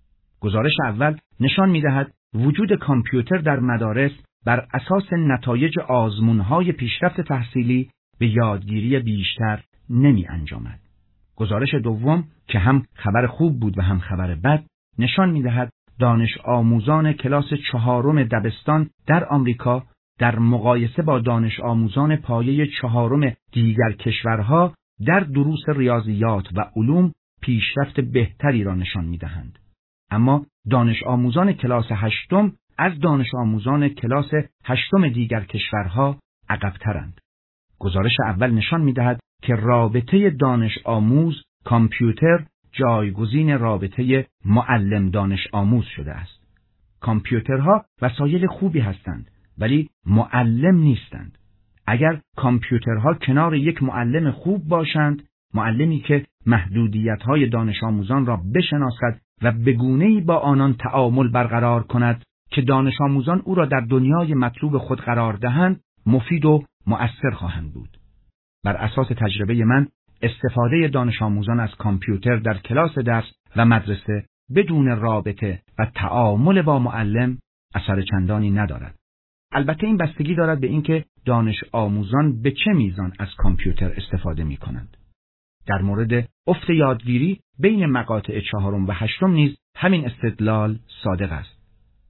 گزارش اول نشان می دهد وجود کامپیوتر در مدارس بر اساس نتایج آزمون‌های پیشرفت تحصیلی به یادگیری بیشتر نمی انجامد. گزارش دوم که هم خبر خوب بود و هم خبر بد نشان می دهد دانش آموزان کلاس چهارم دبستان در آمریکا در مقایسه با دانش آموزان پایه چهارم دیگر کشورها در دروس ریاضیات و علوم پیشرفت بهتری را نشان می دهند. اما دانش آموزان کلاس هشتم از دانش آموزان کلاس هشتم دیگر کشورها عقب‌ترند. گزارش اول نشان می دهد که رابطه دانش آموز کامپیوتر جایگزین رابطه معلم دانش آموز شده است. کامپیوترها وسایل خوبی هستند ولی معلم نیستند. اگر کامپیوترها کنار یک معلم خوب باشند، معلمی که محدودیت‌های دانش آموزان را بشناسد و به گونه‌ای با آنان تعامل برقرار کند که دانش آموزان او را در دنیای مطلوب خود قرار دهند، مفید و مؤثر خواهند بود. بر اساس تجربه من، استفاده دانش آموزان از کامپیوتر در کلاس درس و مدرسه بدون رابطه و تعامل با معلم اثر چندانی ندارد. البته این بستگی دارد به اینکه دانش آموزان به چه میزان از کامپیوتر استفاده می کنند. در مورد افت یادگیری بین مقاطع چهارم و هشتم نیز همین استدلال صادق است.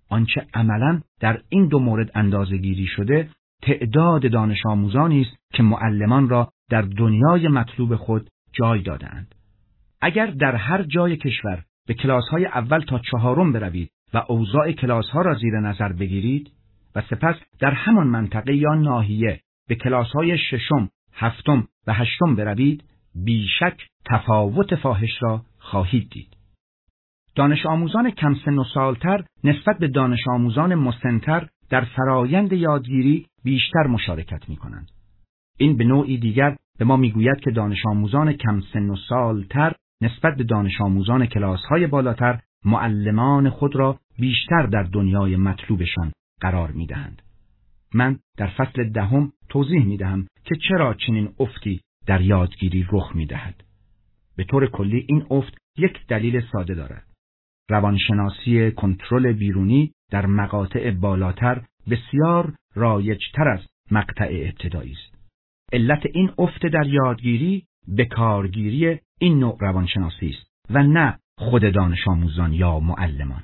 آنچه عملاً در این دو مورد اندازه‌گیری شده تعداد دانش آموزانی است که معلمان را در دنیای مطلوب خود جای دادند. اگر در هر جای کشور به کلاس‌های اول تا چهارم بروید و اوضاع کلاس‌ها را زیر نظر بگیرید و سپس در همان منطقه یا ناحیه به کلاس‌های ششم، هفتم و هشتم بروید، بیشک تفاوت فاحش را خواهید دید. دانش آموزان کم سن و سالتر نسبت به دانش آموزان مسن‌تر در فرایند یادگیری بیشتر مشارکت می‌کنند. این به نوعی دیگر به ما می‌گوید که دانش آموزان کم سن و سالتر نسبت به دانش آموزان کلاس‌های بالاتر معلمان خود را بیشتر در دنیای مطلوبشان قرار می‌دهند. من در فصل دهم توضیح می‌دهم که چرا چنین افتی در یادگیری رخ می‌دهد. به طور کلی این افت یک دلیل ساده دارد. روانشناسی کنترل بیرونی در مقاطع بالاتر بسیار رایج‌تر از مقطع ابتدایی است. علت این افت در یادگیری به کارگیری این نوع روانشناسی است و نه خود دانش آموزان یا معلمان.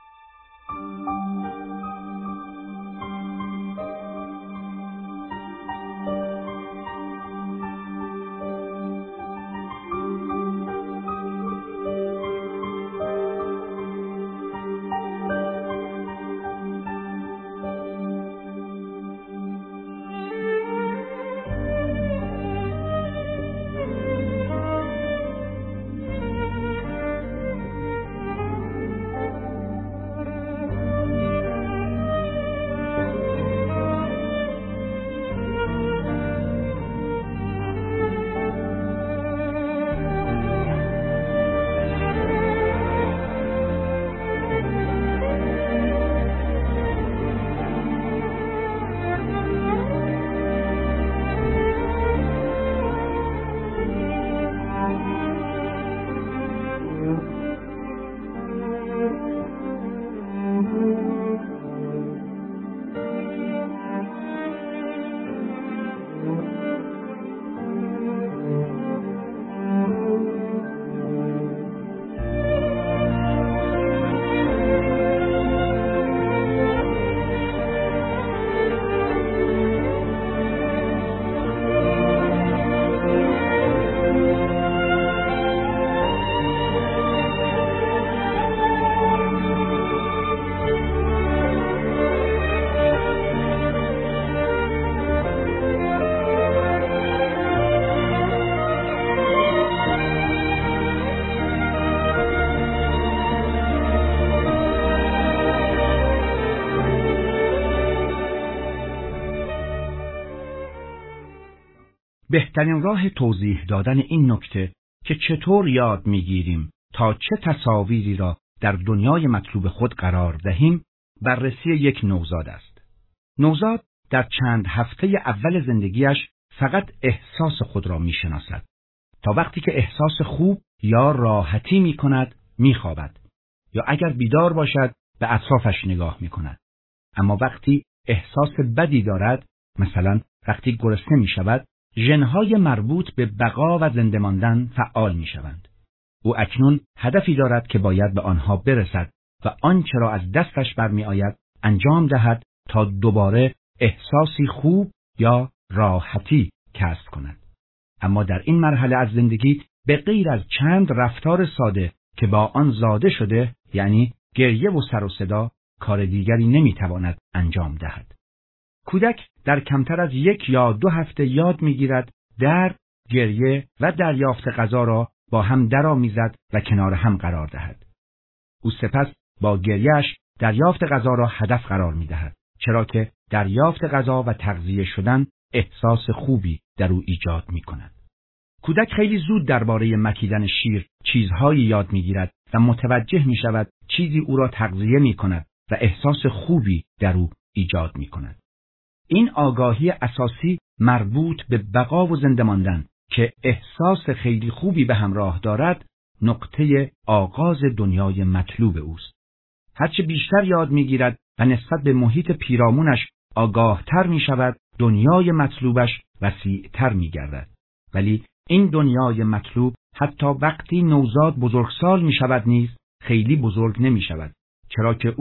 بهترین راه توضیح دادن این نکته که چطور یاد میگیریم تا چه تصاویری را در دنیای مطلوب خود قرار دهیم بررسی یک نوزاد است. نوزاد در چند هفته اول زندگیش فقط احساس خود را میشناسد تا وقتی که احساس خوب یا راحتی میکند میخوابد یا اگر بیدار باشد به اطرافش نگاه میکند. اما وقتی احساس بدی دارد، مثلا وقتی گرسنه میشود، ژن‌های مربوط به بقا و زنده ماندن فعال میشوند. او اکنون هدفی دارد که باید به آنها برسد و آنچه را از دستش برمی آید انجام دهد تا دوباره احساسی خوب یا راحتی کسب کند. اما در این مرحله از زندگی به غیر از چند رفتار ساده که با آن زاده شده، یعنی گریه و سر و صدا، کار دیگری نمیتواند انجام دهد. کودک در کمتر از یک یا دو هفته یاد میگیرد درد، گریه و دریافت غذا را با هم درآمیزد و کنار هم قرار دهد. او سپس با گریهش دریافت غذا را هدف قرار میدهد، چرا که دریافت غذا و تغذیه شدن احساس خوبی در او ایجاد میکند. کودک خیلی زود درباره مکیدن شیر چیزهایی یاد میگیرد و متوجه میشود چیزی او را تغذیه میکند و احساس خوبی در او ایجاد میکند. این آگاهی اساسی مربوط به بقا و زنده ماندن که احساس خیلی خوبی به همراه دارد، نقطه آغاز دنیای مطلوب اوست. هرچه بیشتر یاد میگیرد و نسبت به محیط پیرامونش آگاهتر میشود، دنیای مطلوبش وسیعتر میگردد. ولی این دنیای مطلوب حتی وقتی نوزاد بزرگسال میشود نیز خیلی بزرگ نمیشود، چرا که او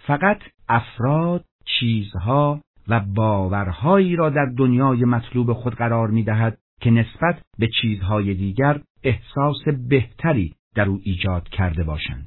فقط افراد، چیزها و باورهایی را در دنیای مطلوب خود قرار می‌دهد که نسبت به چیزهای دیگر احساس بهتری در او ایجاد کرده باشند.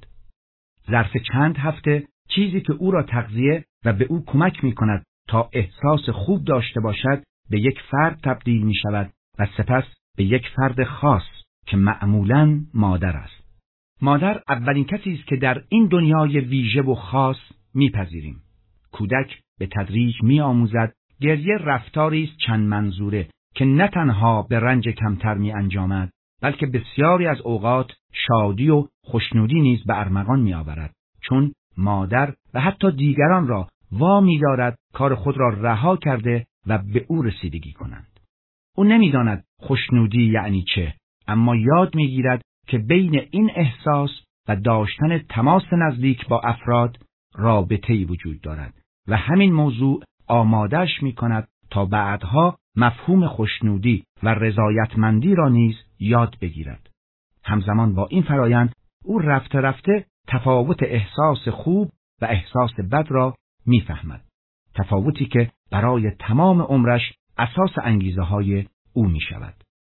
ظرف چند هفته چیزی که او را تغذیه و به او کمک می‌کند تا احساس خوب داشته باشد به یک فرد تبدیل می‌شود و سپس به یک فرد خاص که معمولاً مادر است. مادر اولین کسی است که در این دنیای ویژه و خاص می‌پذیریم. کودک به تدریج می‌آموزد گریه رفتاری است چند منظوره که نه تنها به رنج کمتر می‌انجامد، بلکه بسیاری از اوقات شادی و خوشنودی نیز به ارمغان می‌آورد، چون مادر و حتی دیگران را وامی دارد کار خود را رها کرده و به او رسیدگی کنند. او نمی‌داند خوشنودی یعنی چه، اما یاد می‌گیرد که بین این احساس و داشتن تماس نزدیک با افراد رابطه‌ای وجود دارد و همین موضوع آماده‌اش می‌کند تا بعدها مفهوم خوشنودی و رضایتمندی را نیز یاد بگیرد. همزمان با این فرایند او رفته رفته تفاوت احساس خوب و احساس بد را می‌فهمد. تفاوتی که برای تمام عمرش اساس انگیزه‌های او می‌شود.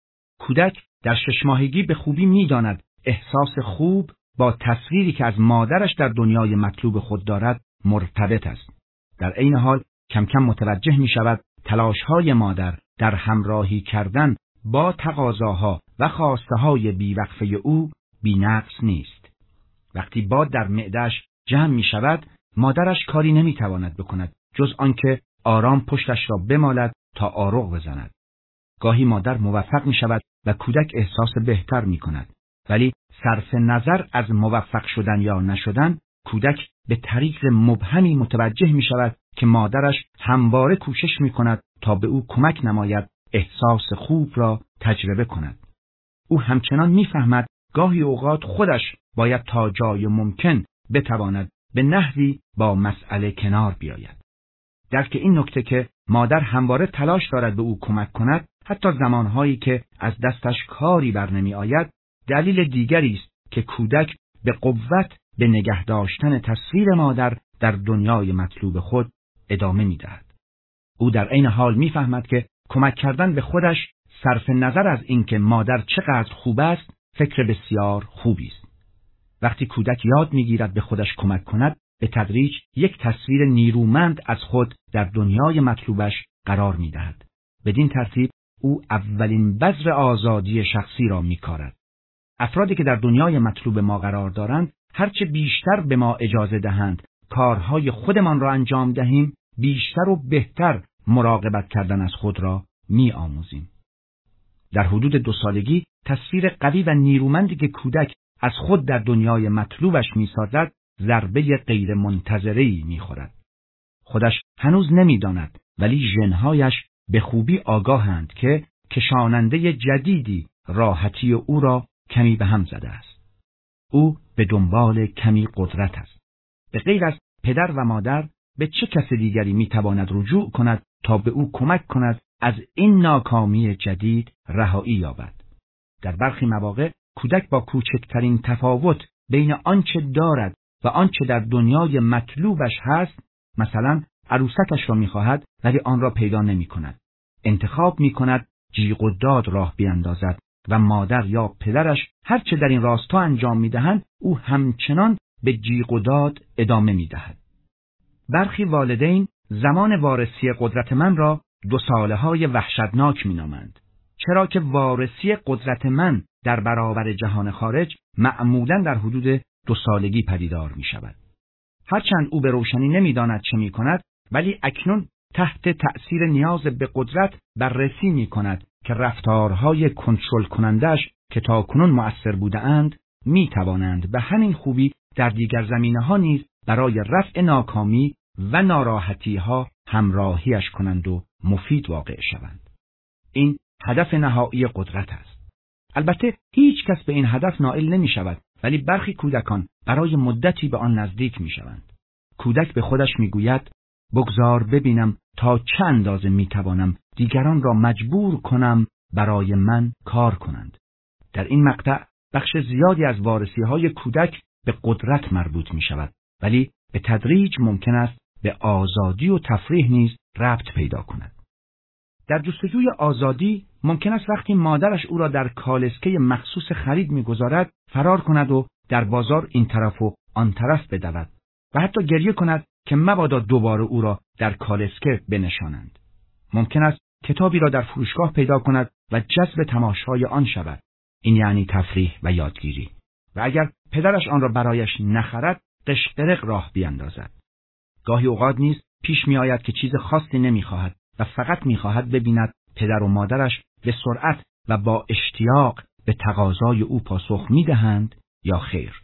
کودک در شش ماهگی به خوبی می‌داند احساس خوب با تصویری که از مادرش در دنیای مطلوب خود دارد مرتبط است. در عین حال کم کم متوجه می‌شود تلاش‌های مادر در همراهی کردن با تقاضاها و خواسته‌های بی‌وقفه او بی‌نقص نیست. وقتی باد در معده‌اش جمع می‌شود، مادرش کاری نمی‌تواند بکند جز آنکه آرام پشتش را بمالد تا آروغ بزند. گاهی مادر موفق می‌شود و کودک احساس بهتر می‌کند، ولی صرف نظر از موفق شدن یا نشدن، کودک به طریق مبهمی متوجه می‌شود که مادرش همواره کوشش می‌کند تا به او کمک نماید احساس خوب را تجربه کند. او همچنان می‌فهمد گاهی اوقات خودش باید تا جای ممکن بتواند به نحوی با مسئله کنار بیاید. درک این نکته که مادر همواره تلاش دارد به او کمک کند، حتی زمانهایی که از دستش کاری بر نمی آید، دلیل دیگری است که کودک به قوت به نگه داشتن تصویر مادر در دنیای مطلوب خود ادامه می دهد. او در عین حال می فهمد که کمک کردن به خودش صرف نظر از اینکه مادر چقدر خوب است، فکر بسیار خوبی است. وقتی کودک یاد می گیرد به خودش کمک کند، به تدریج یک تصویر نیرومند از خود در دنیای مطلوبش قرار می دهد. بدین ترتیب او اولین بذر آزادی شخصی را می کارد. افرادی که در دنیای مطلوب ما قرار دارند، هرچه بیشتر به ما اجازه دهند کارهای خودمان را انجام دهیم، بیشتر و بهتر مراقبت کردن از خود را می آموزیم. در حدود دو سالگی تصویر قوی و نیرومندی که کودک از خود در دنیای مطلوبش می سازد، ضربه غیر منتظره‌ای می خورد. خودش هنوز نمی داند، ولی ژن‌هایش به خوبی آگاهند که کشاننده جدیدی راحتی او را کمی به هم زده است. او به دنبال کمی قدرت است. به غیر از پدر و مادر به چه کس دیگری می تواند رجوع کند تا به او کمک کند از این ناکامی جدید رهایی یابد؟ در برخی مواقع کودک با کوچکترین تفاوت بین آنچه دارد و آنچه در دنیای مطلوبش هست، مثلا عروسکش را می‌خواهد ولی آن را پیدا نمی‌کند، انتخاب می‌کند جیغ و داد راه بیاندازد و مادر یا پدرش هر چه در این راستا انجام می‌دهند، او همچنان به جیغ و داد ادامه می‌دهد. برخی والدین زمان وارسی قدرت من را دو ساله‌های وحشتناک می‌نامند، چرا که وارسی قدرت من در برابر جهان خارج معمولاً در حدود دو سالگی پدیدار می شود. هرچند او به روشنی نمی داند چه می کند، ولی اکنون تحت تأثیر نیاز به قدرت بررسی می کند که رفتارهای کنترل کنندش که تاکنون مؤثر بوده اند می توانند به همین خوبی در دیگر زمینه ها نیز برای رفع ناکامی و ناراحتی ها همراهیش کنند و مفید واقع شوند. این هدف نهایی قدرت است. البته هیچ کس به این هدف نائل نمی شود، ولی برخی کودکان برای مدتی به آن نزدیک می شوند. کودک به خودش می گوید بگذار ببینم تا چه اندازه می توانم دیگران را مجبور کنم برای من کار کنند. در این مقطع بخش زیادی از وارسی های کودک به قدرت مربوط می شود، ولی به تدریج ممکن است به آزادی و تفریح نیز ربط پیدا کند. در جستجوی آزادی ممکن است وقتی مادرش او را در کالسکه مخصوص خرید می‌گذارد فرار کند و در بازار این طرف و آن طرف بدود و حتی گریه کند که مبادا دوباره او را در کالسکه بنشانند. ممکن است کتابی را در فروشگاه پیدا کند و جذب تماشای آن شود. این یعنی تفریح و یادگیری. و اگر پدرش آن را برایش نخرد، قشقرق راه بیاندازد. گاهی اوقات نیز پیش می آید که چیز خاصی نمی خواهد و فقط می خواهد ببیند پدر و مادرش به سرعت و با اشتیاق به تقاضای او پاسخ می دهند یا خیر.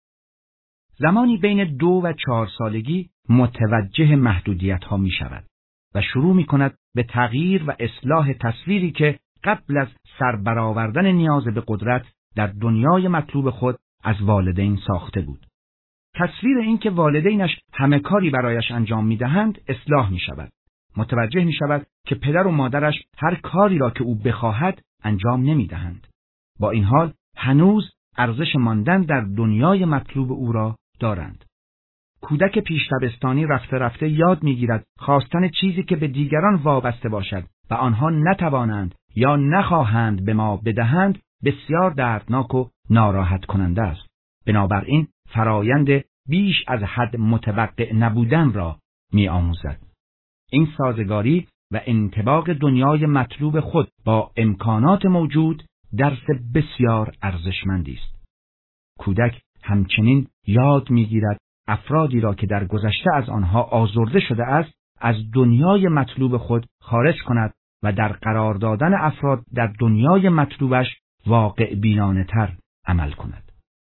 زمانی بین دو و چهار سالگی متوجه محدودیت ها می شود و شروع می کند به تغییر و اصلاح تصویری که قبل از سربرآوردن نیاز به قدرت در دنیای مطلوب خود از والدین ساخته بود. تصویر این که والدینش همه کاری برایش انجام می دهند اصلاح می شود. متوجه می شود که پدر و مادرش هر کاری را که او بخواهد انجام نمی دهند. با این حال هنوز ارزش ماندن در دنیای مطلوب او را دارند. کودک پیش دبستانی رفته رفته یاد می گیرد خواستن چیزی که به دیگران وابسته باشد و آنها نتوانند یا نخواهند به ما بدهند بسیار دردناک و ناراحت کننده است. بنابراین فرایند بیش از حد متوقع نبودن را می آموزد. این سازگاری و انطباق دنیای مطلوب خود با امکانات موجود درس بسیار ارزشمندی است. کودک همچنین یاد می‌گیرد افرادی را که در گذشته از آنها آزرده شده است از دنیای مطلوب خود خارج کند و در قرار دادن افراد در دنیای مطلوبش واقع بینانه تر عمل کند.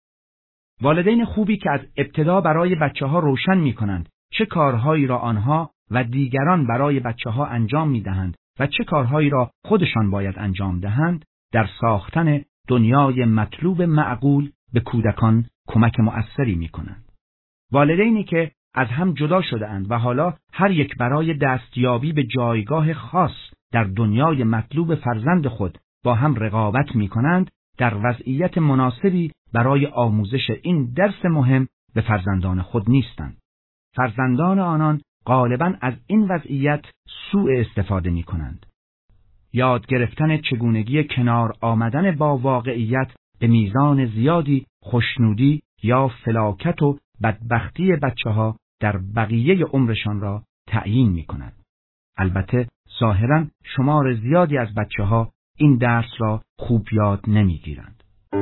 والدین خوبی که از ابتدا برای بچه ها روشن می کنند چه کارهایی را آنها و دیگران برای بچه ها انجام می دهند و چه کارهایی را خودشان باید انجام دهند، در ساختن دنیای مطلوب معقول به کودکان کمک مؤثری می کنند. والدینی که از هم جدا شده اند و حالا هر یک برای دستیابی به جایگاه خاص در دنیای مطلوب فرزند خود با هم رقابت می کنند، در وضعیت مناسبی برای آموزش این درس مهم به فرزندان خود نیستند. فرزندان آنان غالباً از این وضعیت سوء استفاده می کنند. یاد گرفتن چگونگی کنار آمدن با واقعیت به میزان زیادی خوشنودی یا فلاکت و بدبختی بچه ها در بقیه عمرشان را تعیین می کند. البته ظاهراً شمار زیادی از بچه ها این درس را خوب یاد نمی گیرند.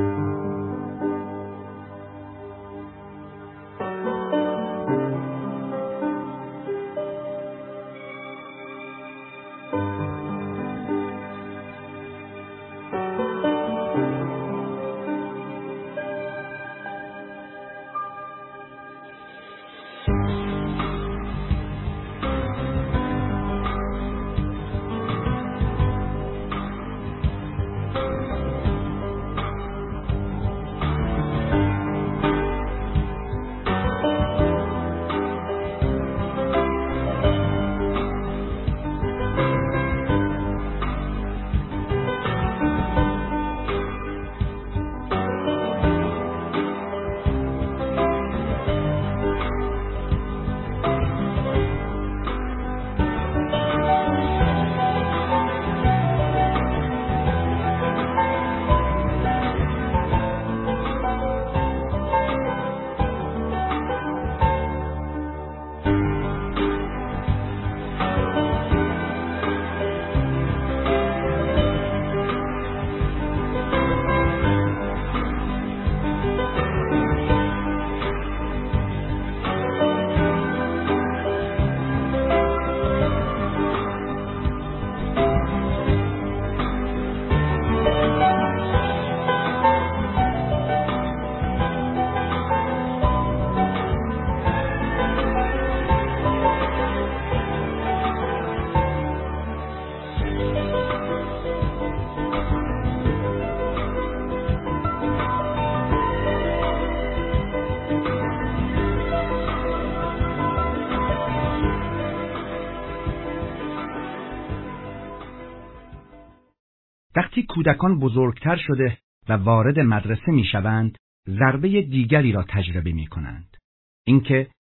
وقتی کودکان بزرگتر شده و وارد مدرسه می شوند، ضربه دیگری را تجربه می کنند. اینکه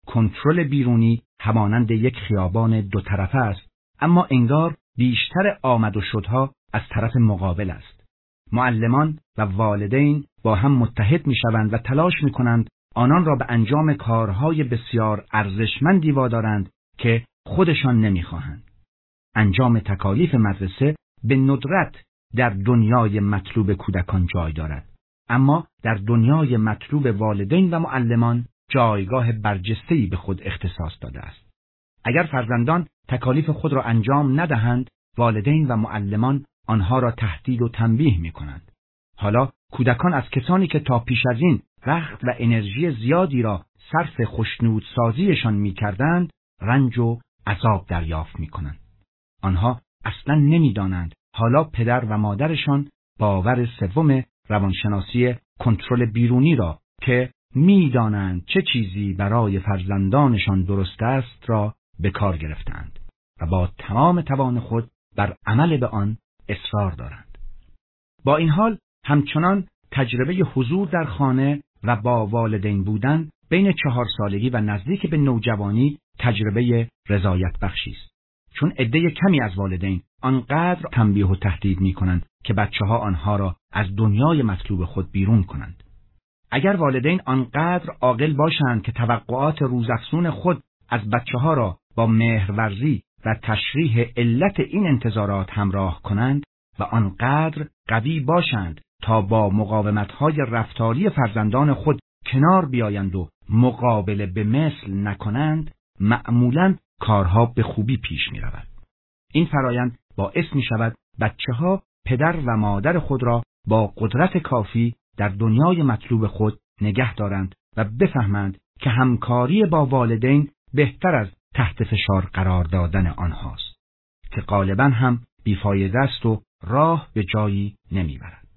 کنترل بیرونی همانند یک خیابان دو طرفه است، اما انگار بیشتر آمد و شدها از طرف مقابل است. معلمان و والدین با هم متحد می‌شوند و تلاش می‌کنند آنان را به انجام کارهای بسیار ارزشمندی وادارند که خودشان نمی‌خواهند. انجام تکالیف مدرسه به ندرت در دنیای مطلوب کودکان جای دارد، اما در دنیای مطلوب والدین و معلمان جایگاه برجسته‌ای به خود اختصاص داده است. اگر فرزندان تکالیف خود را انجام ندهند، والدین و معلمان آنها را تهدید و تنبیه می‌کنند. حالا کودکان از کسانی که تا پیش از این وقت و انرژی زیادی را صرف خوشنودسازیشان می‌کردند، رنج و عذاب دریافت می‌کنند. آنها اصلاً نمی‌دانند حالا پدر و مادرشان باور سوم روانشناسی کنترل بیرونی را که می‌دانند چه چیزی برای فرزندانشان درست است را به کار گرفتند و با تمام توان خود بر عمل به آن اصرار دارند. با این حال همچنان تجربه حضور در خانه و با والدین بودن بین چهار سالگی و نزدیک به نوجوانی تجربه رضایت بخشی است، چون عده کمی از والدین آنقدر تنبیه و تهدید می‌کنند که بچه‌ها آنها را از دنیای مطلوب خود بیرون کنند. اگر والدین آنقدر عاقل باشند که توقعات روزافزون خود از بچه‌ها را با مهرورزی و تشریح علت این انتظارات همراه کنند و آنقدر قوی باشند تا با مقاومت‌های رفتاری فرزندان خود کنار بیایند و مقابله به مثل نکنند، معمولاً کارها به خوبی پیش می رود. این فرایند باعث می شود بچه‌ها پدر و مادر خود را با قدرت کافی در دنیای مطلوب خود نگه دارند و بفهمند که همکاری با والدین بهتر از تحت فشار قرار دادن آنهاست، که غالباً هم بیفایده است و راه به جایی نمی برد.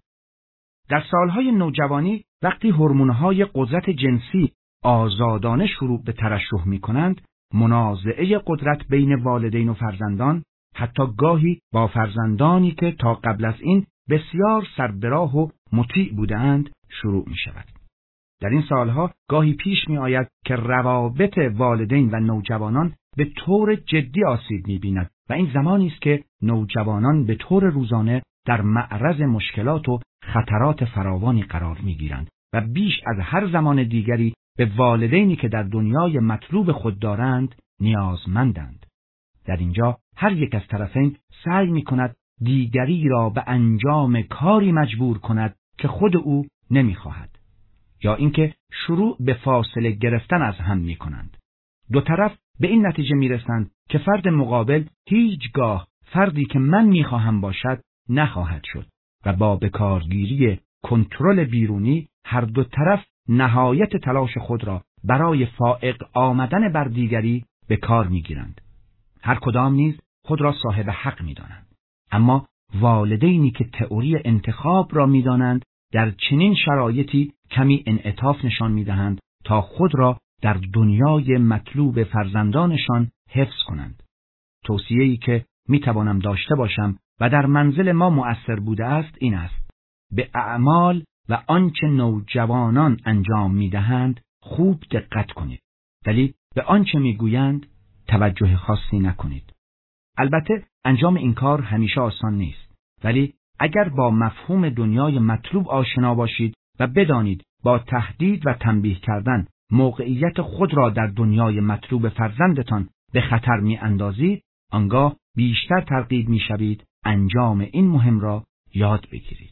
در سالهای نوجوانی وقتی هورمون‌های قدرت جنسی آزادانه شروع به ترشح می کنند، منازعه قدرت بین والدین و فرزندان، حتی گاهی با فرزندانی که تا قبل از این بسیار سربراه و مطیع بودند، شروع می شود. در این سالها گاهی پیش می آید که روابط والدین و نوجوانان به طور جدی آسیب می بیند و این زمانی است که نوجوانان به طور روزانه در معرض مشکلات و خطرات فراوانی قرار می گیرند و بیش از هر زمان دیگری به والدینی که در دنیای مطلوب خود دارند نیازمندند. در اینجا هر یک از طرفین سعی می کند دیگری را به انجام کاری مجبور کند که خود او نمی خواهد، یا اینکه شروع به فاصله گرفتن از هم می کنند. دو طرف به این نتیجه می رسند که فرد مقابل هیچگاه فردی که من می خواهم باشد نخواهد شد و با بکارگیری کنترل بیرونی هر دو طرف نهایت تلاش خود را برای فائق آمدن بر دیگری به کار می گیرند. هر کدام نیز خود را صاحب حق می دانند. اما والدینی که تئوری انتخاب را می دانند در چنین شرایطی کمی انعطاف نشان می دهند تا خود را در دنیای مطلوب فرزندانشان حفظ کنند. توصیه‌ای که می توانم داشته باشم و در منزل ما مؤثر بوده است این است: به اعمال و آنچه نوجوانان انجام می دهند خوب دقت کنید، ولی به آنچه می گویند توجه خاصی نکنید. البته انجام این کار همیشه آسان نیست، ولی اگر با مفهوم دنیای مطلوب آشنا باشید و بدانید با تهدید و تنبیه کردن موقعیت خود را در دنیای مطلوب فرزندتان به خطر می اندازید، آنگاه بیشتر ترغیب می شوید انجام این مهم را یاد بگیرید.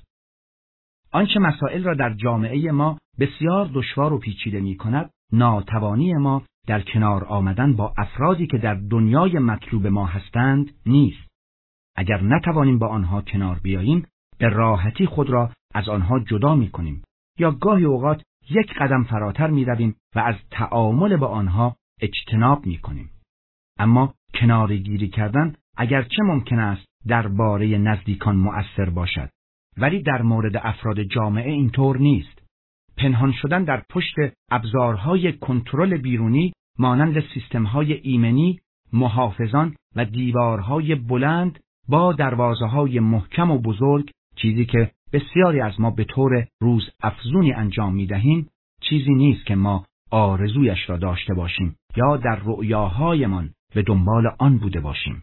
آنچه مسائل را در جامعه ما بسیار دشوار و پیچیده می کند، ناتوانی ما در کنار آمدن با افرادی که در دنیای مطلوب ما هستند نیست. اگر نتوانیم با آنها کنار بیاییم، به راحتی خود را از آنها جدا می کنیم یا گاهی اوقات یک قدم فراتر می رویم و از تعامل با آنها اجتناب می کنیم. اما کنارگیری کردن اگرچه ممکن است درباره نزدیکان مؤثر باشد، ولی در مورد افراد جامعه اینطور نیست. پنهان شدن در پشت ابزارهای کنترل بیرونی مانند سیستم‌های ایمنی، محافظان و دیوارهای بلند با دروازه‌های محکم و بزرگ، چیزی که بسیاری از ما به طور روز افزونی انجام می‌دهیم، چیزی نیست که ما آرزویش را داشته باشیم یا در رؤیاهایمان به دنبال آن بوده باشیم.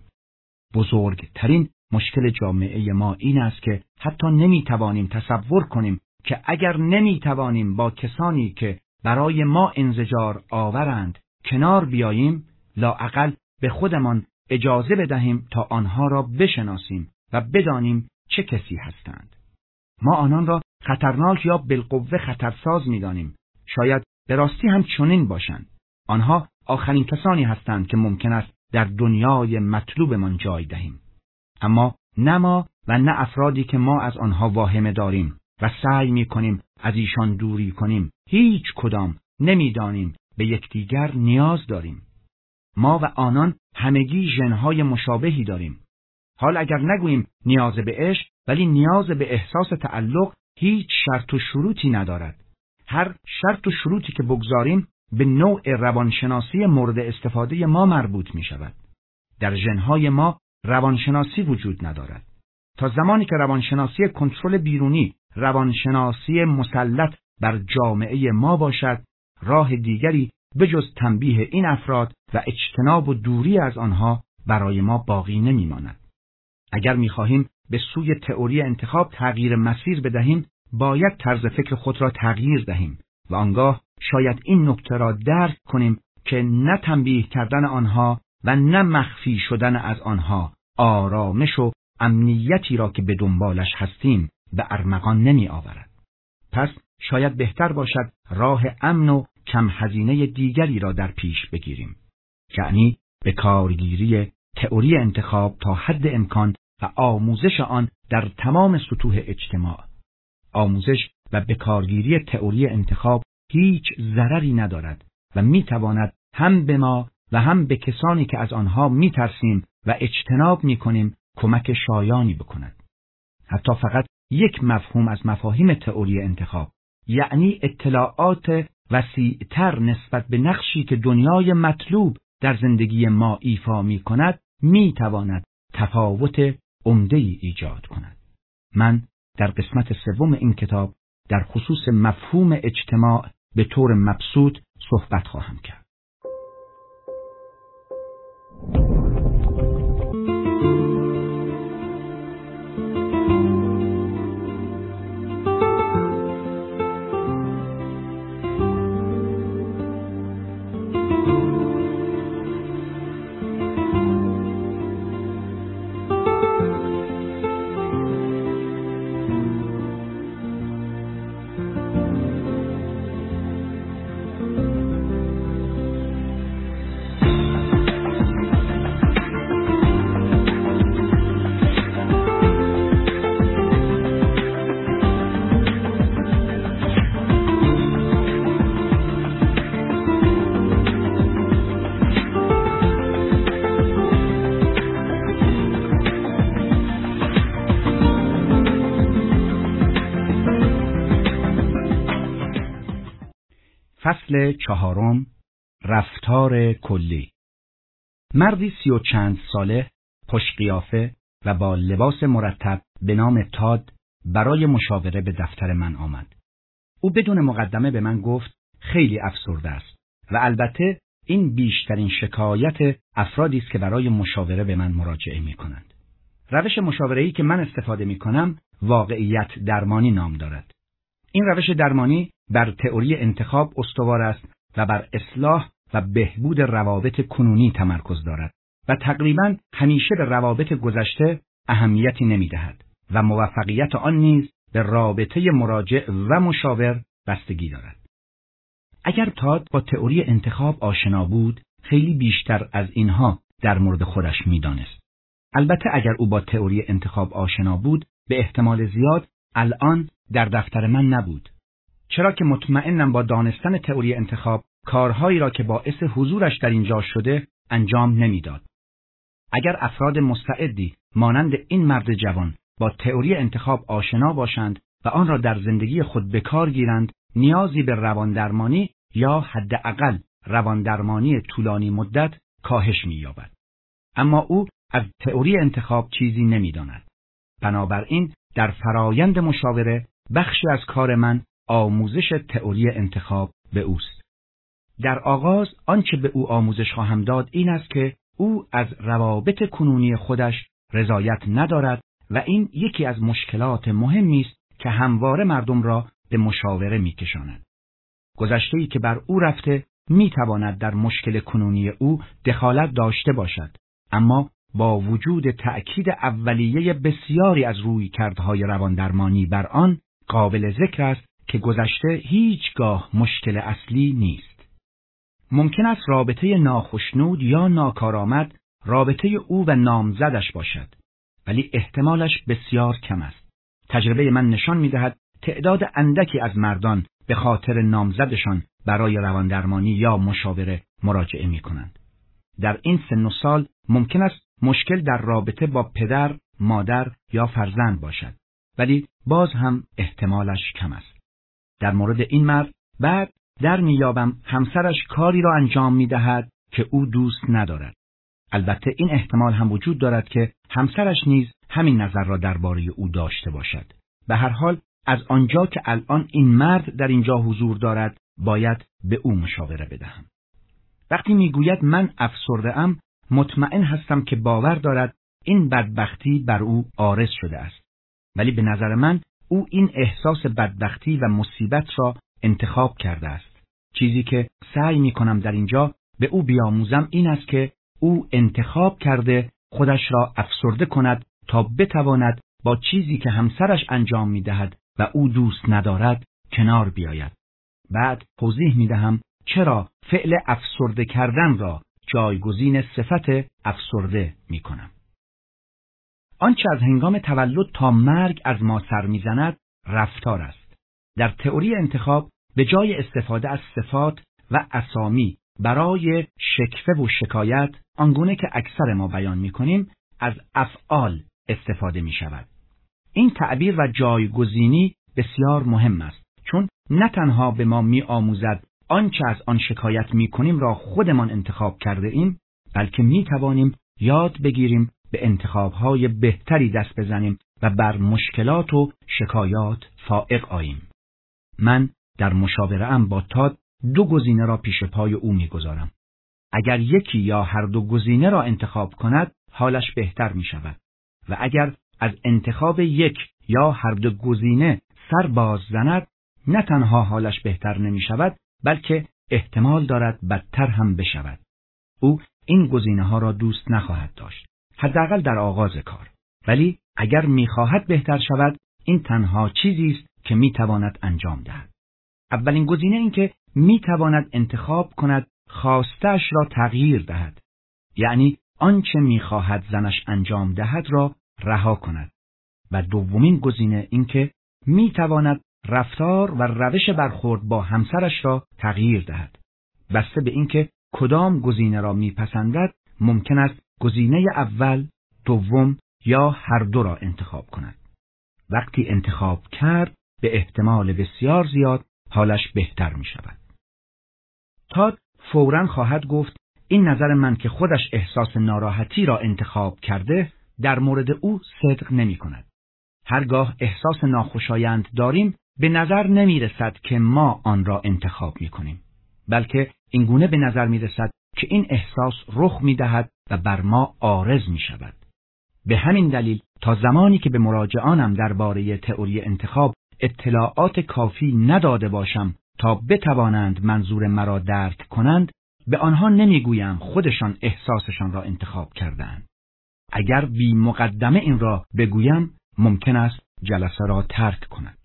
بزرگترین مشکل جامعه ما این است که حتی نمیتوانیم تصور کنیم که اگر نمیتوانیم با کسانی که برای ما انزجار آورند کنار بیاییم، لااقل به خودمان اجازه بدهیم تا آنها را بشناسیم و بدانیم چه کسی هستند. ما آنان را خطرناک یا بالقوه خطرساز می‌دانیم. شاید به راستی هم چنین باشند. آنها آخرین کسانی هستند که ممکن است در دنیای مطلوبمان جای دهیم. اما نه ما و نه افرادی که ما از آنها واهمه داریم و سعی می‌کنیم از ایشان دوری کنیم، هیچ کدام نمی‌دانیم به یکدیگر نیاز داریم. ما و آنان همگی ژن‌های مشابهی داریم. حال اگر نگوییم نیاز به عشق، ولی نیاز به احساس تعلق هیچ شرط و شروطی ندارد. هر شرط و شروطی که بگذاریم به نوع روانشناسی مورد استفاده ما مربوط می شود. در ژن‌های ما روانشناسی وجود ندارد. تا زمانی که روانشناسی کنترل بیرونی، روانشناسی مسلط بر جامعه ما باشد، راه دیگری به جز تنبیه این افراد و اجتناب و دوری از آنها برای ما باقی نمی ماند. اگر می خواهیم به سوی تئوری انتخاب تغییر مسیر بدهیم، باید طرز فکر خود را تغییر دهیم و آنگاه شاید این نکته را درک کنیم که نه تنبیه کردن آنها و نه مخفی شدن از آنها آرامش و امنیتی را که به دنبالش هستیم به ارمغان نمی آورد. پس شاید بهتر باشد راه امن و کم هزینه دیگری را در پیش بگیریم، یعنی به کارگیری تئوری انتخاب تا حد امکان و آموزش آن در تمام سطوح اجتماع. آموزش و به کارگیری تئوری انتخاب هیچ ضرری ندارد و میتواند هم به ما و هم به کسانی که از آنها میترسیم و اجتناب میکنیم کمک شایانی بکند. حتی فقط یک مفهوم از مفاهیم تئوری انتخاب، یعنی اطلاعات وسیع‌تر نسبت به نقشی که دنیای مطلوب در زندگی ما ایفا میکند، میتواند تفاوت عمده‌ای ایجاد کند. من در قسمت سوم این کتاب در خصوص مفهوم اجتماع به طور مبسوط صحبت خواهم کرد. فصل چهارم، رفتار کلی. مردی سی و چند ساله، خوش قیافه و با لباس مرتب به نام تاد برای مشاوره به دفتر من آمد. او بدون مقدمه به من گفت خیلی افسرده است و البته این بیشترین شکایت افرادی است که برای مشاوره به من مراجعه می کنند. روش مشاوره‌ای که من استفاده می کنم واقعیت درمانی نام دارد. این روش درمانی بر تئوری انتخاب استوار است و بر اصلاح و بهبود روابط کنونی تمرکز دارد و تقریباً همیشه به روابط گذشته اهمیتی نمی‌دهد و موفقیت آن نیز به رابطه مراجع و مشاور بستگی دارد. اگر تاد با تئوری انتخاب آشنا بود، خیلی بیشتر از اینها در مورد خودش می‌دانست. البته اگر او با تئوری انتخاب آشنا بود، به احتمال زیاد الان در دفتر من نبود. چرا که مطمئنم با دانستن تئوری انتخاب کارهایی را که باعث حضورش در اینجا شده انجام نمیداد. اگر افراد مستعدی مانند این مرد جوان با تئوری انتخاب آشنا باشند و آن را در زندگی خود به کار گیرند، نیازی به رواندرمانی یا حداقل رواندرمانی طولانی مدت کاهش می‌یابد. اما او از تئوری انتخاب چیزی نمی‌داند. بنابراین در فرایند مشاوره بخشی از کار من آموزش تئوری انتخاب به اوست. در آغاز آنچه به او آموزش خواهم داد این است که او از روابط کنونی خودش رضایت ندارد و این یکی از مشکلات مهمی است که همواره مردم را به مشاوره می‌کشاند. گذشته‌ای که بر او رفته می‌تواند در مشکل کنونی او دخالت داشته باشد، اما با وجود تأکید اولیه بسیاری از رویکردهای رواندرمانی بر آن، قابل ذکر است که گذشته هیچگاه مشکل اصلی نیست. ممکن است رابطه ناخشنود یا ناکارآمد رابطه او و نامزدش باشد، ولی احتمالش بسیار کم است. تجربه من نشان می‌دهد تعداد اندکی از مردان به خاطر نامزدشان برای رواندرمانی یا مشاوره مراجعه می‌کنند. در این سن و سال ممکن است مشکل در رابطه با پدر، مادر یا فرزند باشد، ولی باز هم احتمالش کم است. در مورد این مرد بعد در میابم همسرش کاری را انجام میدهد که او دوست ندارد. البته این احتمال هم وجود دارد که همسرش نیز همین نظر را درباره او داشته باشد. به هر حال از آنجا که الان این مرد در اینجا حضور دارد باید به او مشاوره بدهم. وقتی میگوید من افسرده ام، مطمئن هستم که باور دارد این بدبختی بر او عارض شده است. ولی به نظر من او این احساس بدبختی و مصیبت را انتخاب کرده است. چیزی که سعی می کنم در اینجا به او بیاموزم این است که او انتخاب کرده خودش را افسرده کند تا بتواند با چیزی که همسرش انجام می دهد و او دوست ندارد کنار بیاید. بعد توضیح می دهم چرا فعل افسرده کردن را جایگزین صفت افسرده می کنم. آنچه از هنگام تولد تا مرگ از ما سر می زند رفتار است. در تئوری انتخاب به جای استفاده از صفات و اسامی برای شکوه و شکایت، آنگونه که اکثر ما بیان می کنیم، از افعال استفاده می شود. این تعبیر و جایگزینی بسیار مهم است، چون نه تنها به ما می آموزد آنچه از آن شکایت می کنیم را خودمان انتخاب کرده ایم، بلکه می توانیم یاد بگیریم به انتخابهای بهتری دست بزنیم و بر مشکلات و شکایات فائق آییم. من در مشاوره ام با تاد دو گزینه را پیش پای او می گذارم. اگر یکی یا هر دو گزینه را انتخاب کند، حالش بهتر می شود و اگر از انتخاب یک یا هر دو گزینه سر باز زند، نه تنها حالش بهتر نمی شود، بلکه احتمال دارد بدتر هم بشود. او این گزینه ها را دوست نخواهد داشت، حداقل در آغاز کار. ولی اگر می‌خواهد بهتر شود، این تنها چیزی است که می‌تواند انجام دهد. اولین گزینه این که می‌تواند انتخاب کند خواسته‌اش را تغییر دهد، یعنی آنچه می‌خواهد زنش انجام دهد را رها کند. و دومین گزینه این که می‌تواند رفتار و روش برخورد با همسرش را تغییر دهد. بسته به اینکه کدام گزینه را می‌پسندد، ممکن است گزینه اول، دوم یا هر دو را انتخاب کند. وقتی انتخاب کرد، به احتمال بسیار زیاد حالش بهتر می شود. تاد فوراً خواهد گفت این نظر من که خودش احساس ناراحتی را انتخاب کرده در مورد او صدق نمی کند. هرگاه احساس ناخوشایند داریم، به نظر نمی رسد که ما آن را انتخاب می کنیم، بلکه اینگونه به نظر می رسد که این احساس رخ می دهد و بر ما عارض می شود. به همین دلیل تا زمانی که به مراجعانم درباره تئوری انتخاب اطلاعات کافی نداده باشم تا بتوانند منظور مرا درک کنند، به آنها نمیگویم خودشان احساسشان را انتخاب کردند. اگر بی مقدمه این را بگویم، ممکن است جلسه را ترک کنند.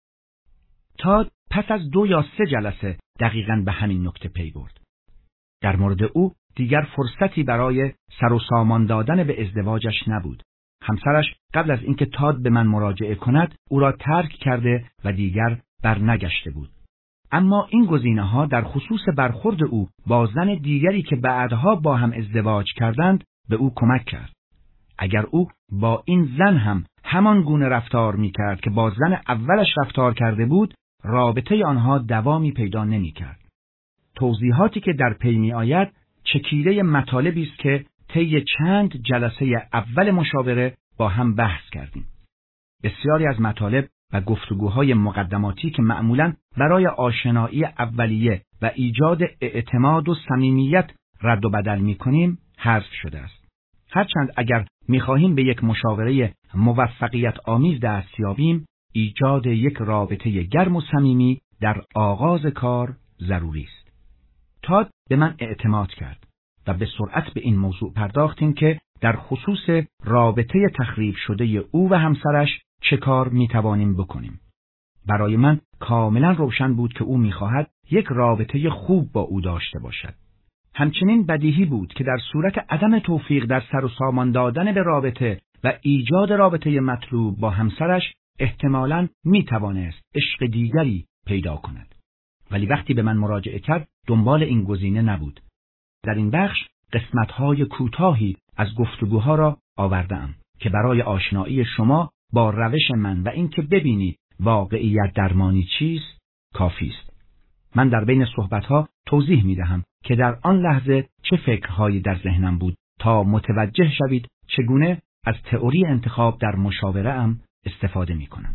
تاد پس از دو یا سه جلسه دقیقاً به همین نکته پی برد. در مورد او دیگر فرصتی برای سر و سامان دادن به ازدواجش نبود. همسرش قبل از اینکه تاد به من مراجعه کند او را ترک کرده و دیگر برنگشته بود. اما این گزینه‌ها در خصوص برخورد او با زن دیگری که بعدها با هم ازدواج کردند به او کمک کرد. اگر او با این زن هم همان گونه رفتار می‌کرد که با زن اولش رفتار کرده بود، رابطه آنها دوامی پیدا نمی‌کرد. توضیحاتی که در پی می‌آید چکیده مطالبی است که طی چند جلسه اول مشاوره با هم بحث کردیم. بسیاری از مطالب و گفتگوهای مقدماتی که معمولاً برای آشنایی اولیه و ایجاد اعتماد و صمیمیت رد و بدل می‌کنیم حذف شده است. هرچند اگر می‌خواهیم به یک مشاوره موفقیت آمیز دست یابیم، ایجاد یک رابطه گرم و صمیمی در آغاز کار ضروری است. تاد به من اعتماد کرد و به سرعت به این موضوع پرداختیم که در خصوص رابطه تخریب شده او و همسرش چه کار می‌توانیم بکنیم. برای من کاملا روشن بود که او می‌خواهد یک رابطه خوب با او داشته باشد. همچنین بدیهی بود که در صورت عدم توفیق در سر و سامان دادن به رابطه و ایجاد رابطه مطلوب با همسرش احتمالاً می‌توانست عشق دیگری پیدا کند. ولی وقتی به من مراجعه کرد دنبال این گزینه نبود. در این بخش قسمت‌های کوتاهی از گفتگوها را آورده‌ام که برای آشنایی شما با روش من و اینکه ببینید واقعیت درمانی چیست کافی است. من در بین صحبت‌ها توضیح می‌دهم که در آن لحظه چه فکرهایی در ذهنم بود تا متوجه شوید چگونه از تئوری انتخاب در مشاوره‌ام استفاده می‌کنم.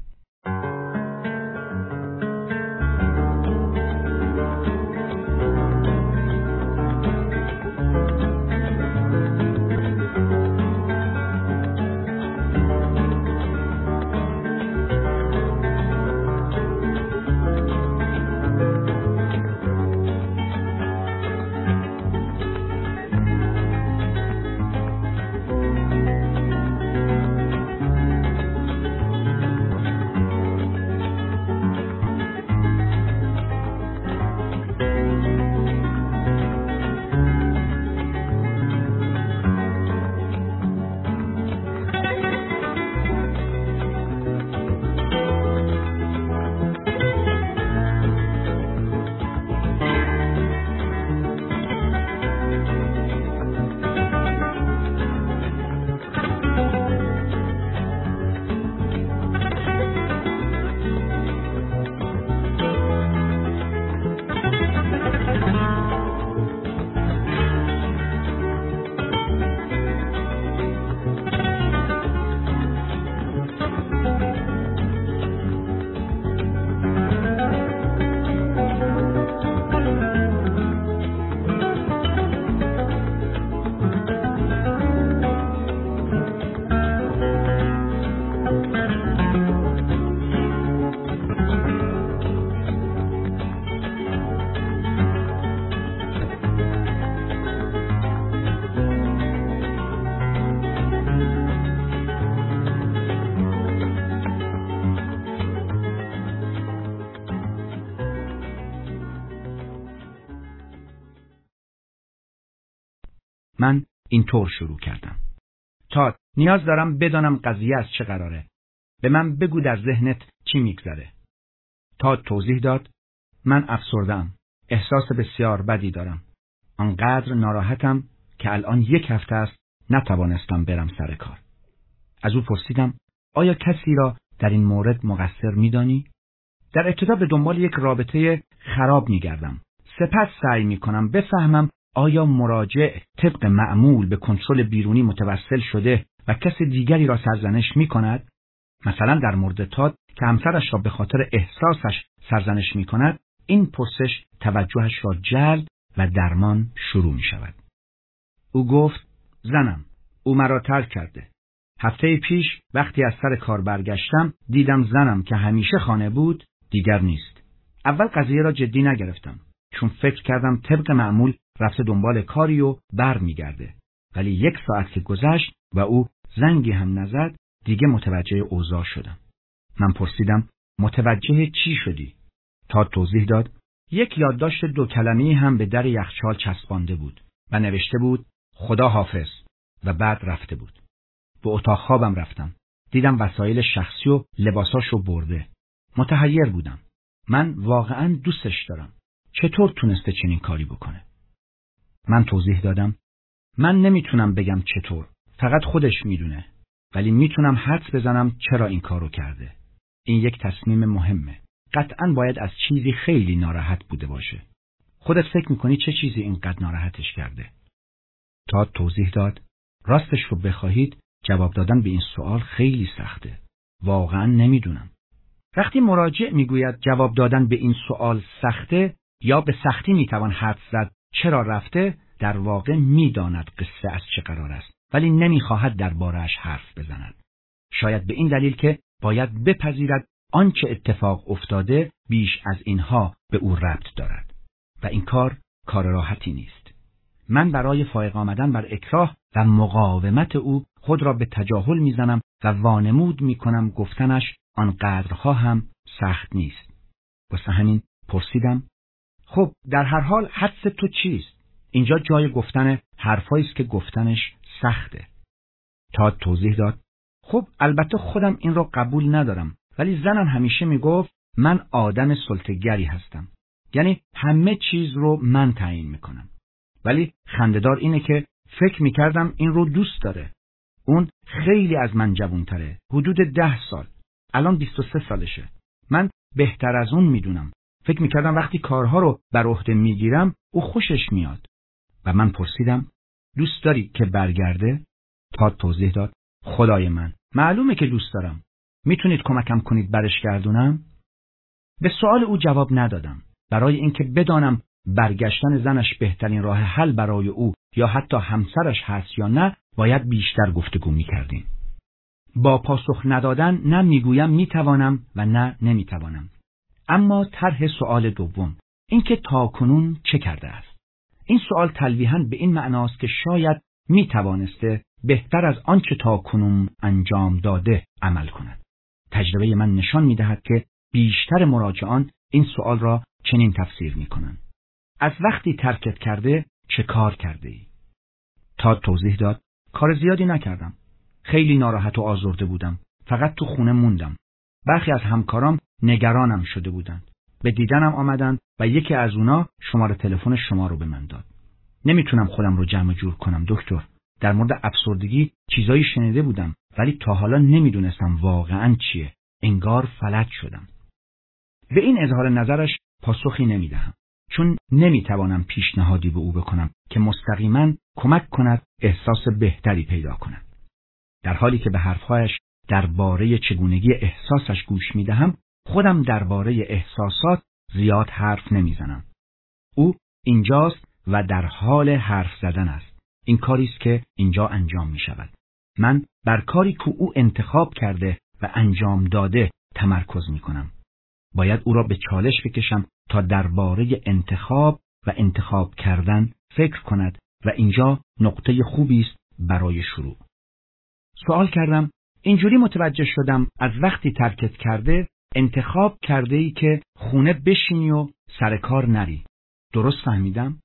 من اینطور شروع کردم. تاد، نیاز دارم بدانم قضیه از چه قراره. به من بگو در ذهنت چی میگذره. تاد توضیح داد. من افسرده‌ام. احساس بسیار بدی دارم. آنقدر ناراحتم که الان یک هفته است نتوانستم برم سر کار. از او پرسیدم آیا کسی را در این مورد مقصر میدانی؟ در ابتدا به دنبال یک رابطه خراب میگردم. سپس سعی میکنم بفهمم آیا مراجع طبق معمول به کنترل بیرونی متوسل شده و کس دیگری را سرزنش میکند؟ مثلا در مورد تاد که همسرش را به خاطر احساسش سرزنش میکند، این پرسش توجهش را جلب و درمان شروع می شود. او گفت زنم، او مرا ترک کرده. هفته پیش وقتی از سر کار برگشتم دیدم زنم که همیشه خانه بود دیگر نیست. اول قضیه را جدی نگرفتم چون فکر کردم طبق معمول رفته دنبال کاری و بر می گرده. ولی یک ساعت که گذشت و او زنگی هم نزد دیگه متوجه اوضاع شدم. من پرسیدم متوجه چی شدی؟ تا توضیح داد یک یادداشت دو کلمه‌ای هم به در یخچال چسبانده بود و نوشته بود خدا حافظ و بعد رفته بود. به اتاق خوابم رفتم. دیدم وسایل شخصی و لباساشو برده. متحیر بودم. من واقعاً دوستش دارم. چطور تونسته چنین کاری بکنه؟ من توضیح دادم من نمیتونم بگم چطور. فقط خودش میدونه. ولی میتونم حدس بزنم چرا این کارو کرده. این یک تصمیم مهمه. قطعاً باید از چیزی خیلی ناراحت بوده باشه. خودت فکر میکنی چه چیزی اینقدر ناراحتش کرده؟ تا توضیح داد راستش رو بخواهید جواب دادن به این سوال خیلی سخته. واقعاً نمیدونم. وقتی مراجع میگوید جواب دادن به این سوال سخته، یا به سختی میتوان حدس زد چرا رفته، در واقع میداند قصه از چه قرار است، ولی نمیخواهد درباره‌اش حرف بزند. شاید به این دلیل که باید بپذیرد آنچه اتفاق افتاده بیش از اینها به او ربط دارد و این کار کار راحتی نیست. من برای فائق آمدن بر اکراه و مقاومت او خود را به تجاهل میزنم و وانمود میکنم گفتنش آنقدرها هم سخت نیست. واسه همین پرسیدم خب در هر حال حدس تو چیست؟ اینجا جای گفتن حرفایی است که گفتنش سخته. تاد توضیح داد خب البته خودم این را قبول ندارم، ولی زنم همیشه میگفت من آدم سلطه‌گری هستم، یعنی همه چیز رو من تعیین میکنم. ولی خنده‌دار اینه که فکر میکردم این رو دوست داره. اون خیلی از من جوان‌تره، حدود ده سال. الان بیست و سه سالشه. من بهتر از اون میدونم. فکر میکردم وقتی کارها رو بر عهده میگیرم او خوشش میاد. و من پرسیدم دوست داری که برگرده؟ تاد توضیح داد خدای من، معلومه که دوست دارم. میتونید کمکم کنید برش گردونم؟ به سوال او جواب ندادم. برای اینکه بدانم برگشتن زنش بهترین راه حل برای او یا حتی همسرش هست یا نه، باید بیشتر گفتگو میکردیم. با پاسخ ندادن نه میگویم میتوانم و نه نمیتوانم. اما طرح سوال دوم، اینکه تاکنون چه کرده است؟ این سوال تلویحاً به این معناست که شاید میتوانسته بهتر از آنچه تاکنون انجام داده عمل کند. تجربه من نشان میدهد که بیشتر مراجعان این سوال را چنین تفسیر میکنند: از وقتی ترکت کرده چه کار کرده ای؟ تاد توضیح داد کار زیادی نکردم. خیلی ناراحت و آزرده بودم. فقط تو خونه موندم. برخی از همکارام نگرانم شده بودند. به دیدنم آمدند و یکی از اونا شماره تلفن شما رو به من داد. نمیتونم خودم رو جمع جور کنم دکتر. در مورد افسردگی چیزایی شنیده بودم ولی تا حالا نمیدونستم واقعاً چیه. انگار فلج شدم. به این اظهار نظرش پاسخی نمیدهم، چون نمیتوانم پیشنهادی به او بکنم که مستقیما کمک کند احساس بهتری پیدا کند. در حالی که به حرفهایش درباره چگونگی احساسش گوش میدهم، خودم درباره احساسات زیاد حرف نمیزنم. او اینجاست و در حال حرف زدن است. این کاری است که اینجا انجام می شود. من بر کاری که او انتخاب کرده و انجام داده تمرکز می کنم. باید او را به چالش بکشم تا درباره انتخاب و انتخاب کردن فکر کند و اینجا نقطه خوبی است برای شروع. سوال کردم اینجوری متوجه شدم از وقتی ترکت کرده انتخاب کرده ای که خونه بشینی و سر کار نری. درست فهمیدم؟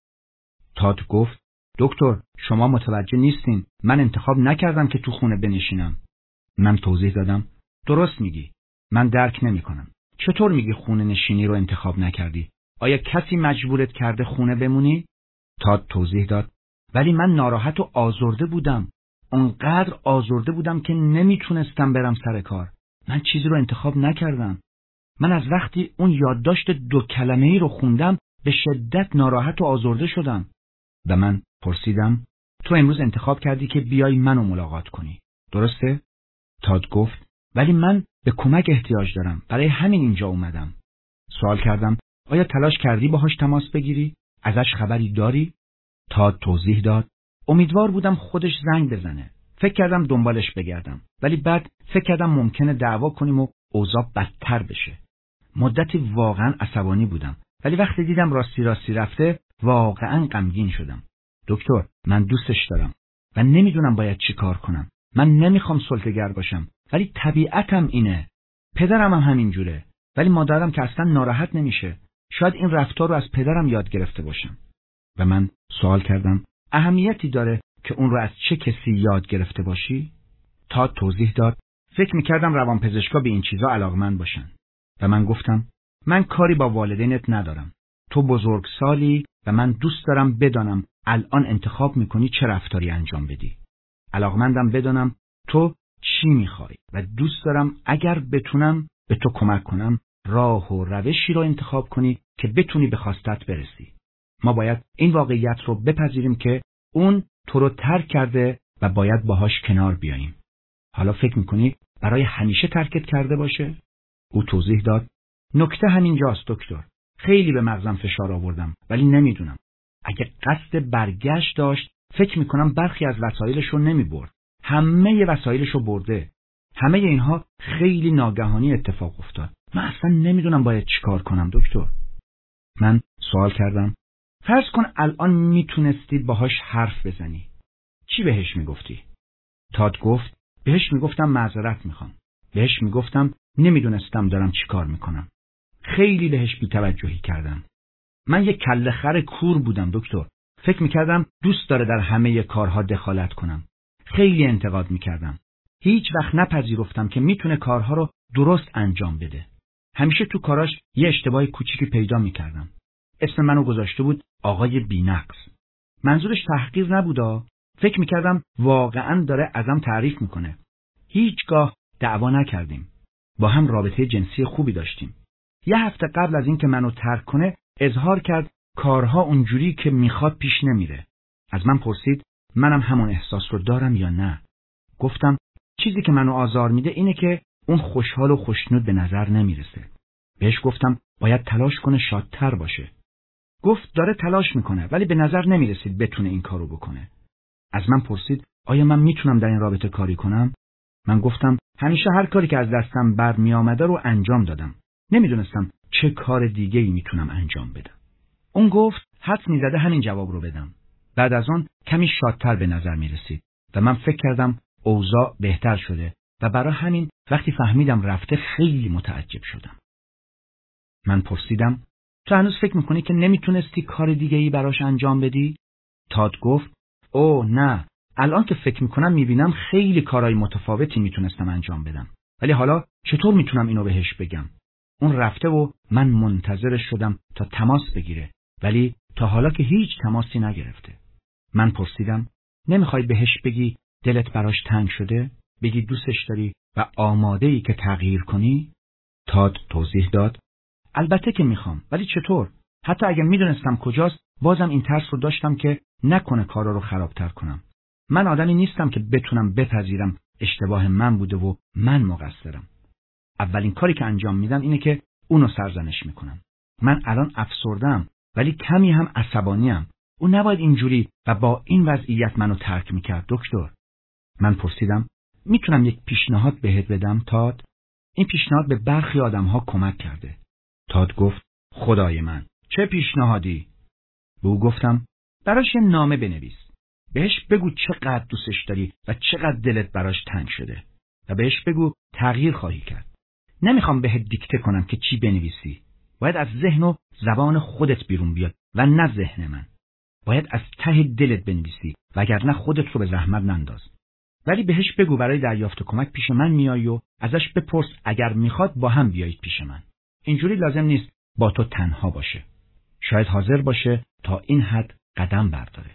تاد گفت دکتر شما متوجه نیستین. من انتخاب نکردم که تو خونه بنشینم. من توضیح دادم درست میگی. من درک نمی کنم. چطور میگی خونه نشینی رو انتخاب نکردی؟ آیا کسی مجبورت کرده خونه بمونی؟ تاد توضیح داد ولی من ناراحت و آزرده بودم. اونقدر آزرده بودم که نمیتونستم برم سر کار. من چیزی رو انتخاب نکردم. من از وقتی اون یادداشت دو کلمه‌ای رو خوندم به شدت ناراحت و آزرده شدم. و من پرسیدم تو امروز انتخاب کردی که بیای منو ملاقات کنی. درسته؟ تاد گفت ولی من به کمک احتیاج دارم. برای همین اینجا اومدم. سوال کردم آیا تلاش کردی باهاش تماس بگیری؟ ازش خبری داری؟ تاد توضیح داد امیدوار بودم خودش زنگ بزنه. فکر کردم دنبالش بگردم. ولی بعد فکر کردم ممکنه دعوا کنیم و اوضاع بدتر بشه. مدتی واقعا عصبانی بودم. ولی وقتی دیدم راستی راستی رفته واقعا غمگین شدم. دکتر من دوستش دارم و نمیدونم باید چی کار کنم. من نمیخوام سلطه‌گر باشم ولی طبیعتم اینه. پدرم هم همین جوره. ولی مادرم که اصلا ناراحت نمیشه. شاید این رفتار رو از پدرم یاد گرفته باشم. و من سوال کردم اهمیتی داره که اون رو از چه کسی یاد گرفته باشی؟ تا توضیح داد فکر میکردم روانپزشکا به این چیزا علاقمند باشن. و من گفتم من کاری با والدینت ندارم. تو بزرگسالی و من دوست دارم بدانم الان انتخاب میکنی چه رفتاری انجام بدی. علاقمندم بدانم تو چی میخوای و دوست دارم اگر بتونم به تو کمک کنم راه و روشی رو انتخاب کنی که بتونی به خواستت برسی. ما باید این واقعیت رو بپذیریم که اون تو رو ترک کرده و باید باهاش کنار بیاییم. حالا فکر میکنی برای همیشه ترکت کرده باشه؟ او توضیح داد نکته همینجاست دکتر. خیلی به مغزم فشار آوردم، ولی نمیدونم. اگه قصد برگشت داشت، فکر میکنم برخی از وسایلش رو نمیبرد. همه وسایلش رو برده. همه اینها خیلی ناگهانی اتفاق افتاد. من اصلا نمیدونم باید چیکار کنم دکتر. من سوال کردم فرض کن الان میتونستی باهاش حرف بزنی. چی بهش میگفتی؟ تاد گفت بهش میگفتم معذرت میخوام. بهش میگفتم نمیدونستم دارم چیکار میکنم. خیلی بهش بی‌توجهی کردم. من یک کله خر کور بودم دکتر. فکر میکردم دوست داره در همه کارها دخالت کنم. خیلی انتقاد میکردم. هیچ وقت نپذیرفتم که میتونه کارها رو درست انجام بده. همیشه تو کاراش یه اشتباه کوچیکی پیدا میکردم. اسم منو گذاشته بود آقای بی‌نقص. منظورش تحقیر نبودا. فکر میکردم واقعاً داره ازم تعریف میکنه. هیچگاه دعوا نکردیم. با هم رابطه جنسی خوبی داشتیم. یه هفته قبل از اینکه منو ترک کنه اظهار کرد کارها اونجوری که میخواد پیش نمیره. از من پرسید منم همون احساس رو دارم یا نه. گفتم چیزی که منو آزار میده اینه که اون خوشحال و خوشنود به نظر نمیرسه. بهش گفتم باید تلاش کنه شادتر باشه. گفت داره تلاش میکنه ولی به نظر نمیرسید بتونه این کارو بکنه. از من پرسید آیا من میتونم در این رابطه کاری کنم؟ من گفتم همیشه هر کاری که از دستم بر میامده رو انجام دادم. نمیدونستم چه کار دیگه‌ای میتونم انجام بدم. اون گفت حدس میزده همین جواب رو بدم. بعد از اون کمی شادتر به نظر میرسید و من فکر کردم اوضاع بهتر شده و برای همین وقتی فهمیدم رفته خیلی متعجب شدم. من پرسیدم تو هنوز فکر میکنی که نمیتونستی کار دیگه‌ای براش انجام بدی؟ تاد گفت اوه نه، الان که فکر میکنم میبینم خیلی کارهای متفاوتی میتونستم انجام بدم. ولی حالا چطور میتونم اینو بهش بگم؟ اون رفته و من منتظرش شدم تا تماس بگیره، ولی تا حالا که هیچ تماسی نگرفته. من پرسیدم نمیخوای بهش بگی دلت براش تنگ شده؟ بگی دوستش داری و آماده‌ای که تغییر کنی؟ تاد توضیح داد البته که میخوام، ولی چطور؟ حتی اگه میدونستم کجاست بازم این ترس رو داشتم که نکنه کارا رو خرابتر کنم. من آدمی نیستم که بتونم بپذیرم اشتباه من بوده و من مقصرم. اولین کاری که انجام میدم اینه که اونو سرزنش میکنم. من الان افسردم ولی کمی هم عصبانیم. اون نباید اینجوری و با این وضعیت منو ترک میکرد دکتر. من پرسیدم میتونم یک پیشنهاد بهت بدم تاد؟ این پیشنهاد به برخی آدمها کمک کرده. تاد گفت خدای من چه پیشنهادی؟ به او گفتم براش یه نامه بنویس. بهش بگو چقدر دوستش داری و چقدر دلت براش تنگ شده و بهش بگو تغییر خواهی کرد. نمیخوام بهت دیکته کنم که چی بنویسی. باید از ذهن و زبان خودت بیرون بیاد و نه ذهن من. باید از ته دلت بنویسی وگرنه خودت رو به زحمت ننداز. ولی بهش بگو برای دریافت کمک پیش من میای و ازش بپرس اگر میخواد با هم بیایید پیش من. اینجوری لازم نیست با تو تنها باشه. شاید حاضر باشه تا این حد قدم برداره.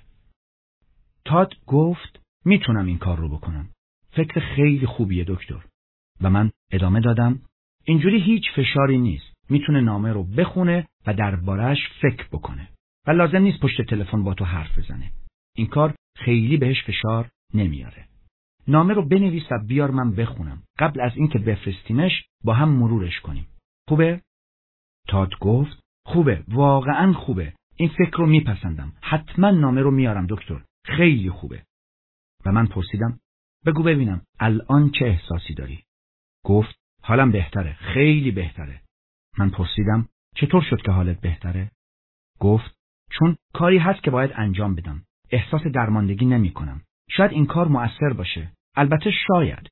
تاد گفت میتونم این کار رو بکنم. فکر خیلی خوبیه دکتر. و من ادامه دادم اینجوری هیچ فشاری نیست. میتونه نامه رو بخونه و درباره‌اش فکر بکنه. و لازم نیست پشت تلفن با تو حرف بزنه. این کار خیلی بهش فشار نمیاره. نامه رو بنویس و بیار من بخونم. قبل از اینکه بفرستیمش با هم مرورش کنیم. خوبه؟ تاد گفت خوبه، واقعاً خوبه. این فکر رو میپسندم. حتما نامه رو میارم دکتر. خیلی خوبه. و من پرسیدم بگو ببینم الان چه احساسی داری؟ گفت حالم بهتره، خیلی بهتره. من پرسیدم چطور شد که حالت بهتره؟ گفت چون کاری هست که باید انجام بدم. احساس درماندگی نمی کنم. شاید این کار مؤثر باشه. البته شاید.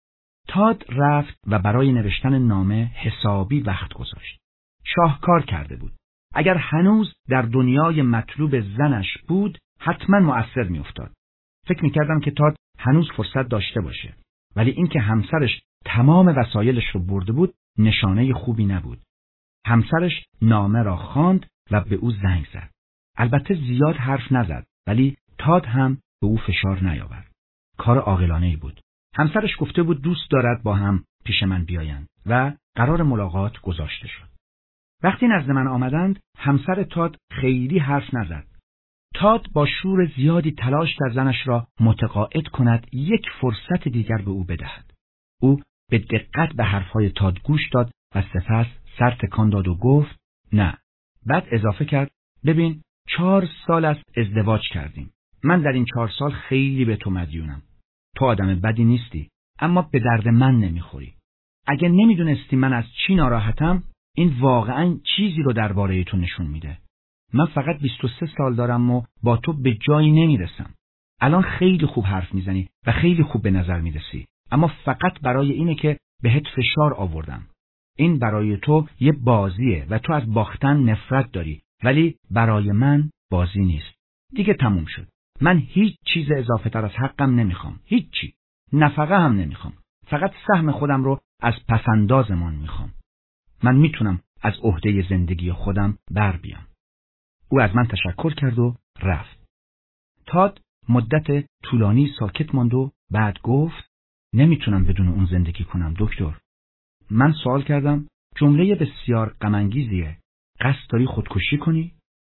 تاد رفت و برای نوشتن نامه حسابی وقت گذاشت. شاهکار کرده بود. اگر هنوز در دنیای مطلوب زنش بود حتما مؤثر می افتاد. فکر می کردم که تاد هنوز فرصت داشته باشه. ولی اینکه همسرش تمام وسایلش رو برده بود نشانه خوبی نبود. همسرش نامه را خواند و به او زنگ زد. البته زیاد حرف نزد ولی تاد هم به او فشار نیاورد. کار عاقلانه‌ای بود. همسرش گفته بود دوست دارد با هم پیش من بیایند و قرار ملاقات گذاشته شد. وقتی نزد من آمدند همسر تاد خیلی حرف نزد. تاد با شور زیادی تلاش کرد زنش را متقاعد کند یک فرصت دیگر به او بدهد. او به دقت به حرفهای تاد گوش داد و سپس سر تکان داد و گفت نه، بعد اضافه کرد ببین چهار سال است ازدواج کردیم. من در این چهار سال خیلی به تو مدیونم. تو آدم بدی نیستی، اما به درد من نمیخوری. اگه نمیدونستی من از چی ناراحتم، این واقعاً چیزی رو درباره تو نشون میده. من فقط بیست و سه سال دارم و با تو به جایی نمیرسم. الان خیلی خوب حرف میزنی و خیلی خوب به نظر میرسی، اما فقط برای اینه که بهت فشار آوردم. این برای تو یه بازیه و تو از باختن نفرت داری، ولی برای من بازی نیست. دیگه تموم شد. من هیچ چیز اضافه تر از حقم نمیخوام. هیچی. نفقه هم نمیخوام. فقط سهم خودم رو از پسندازمان میخوام. من میتونم از عهده زندگی خودم بر بیام. او از من تشکر کرد و رفت. تاد مدت طولانی ساکت ماند و بعد گفت نمیتونم بدون اون زندگی کنم دکتر. من سوال کردم جمله بسیار غم‌انگیزیه. قصد داری خودکشی کنی؟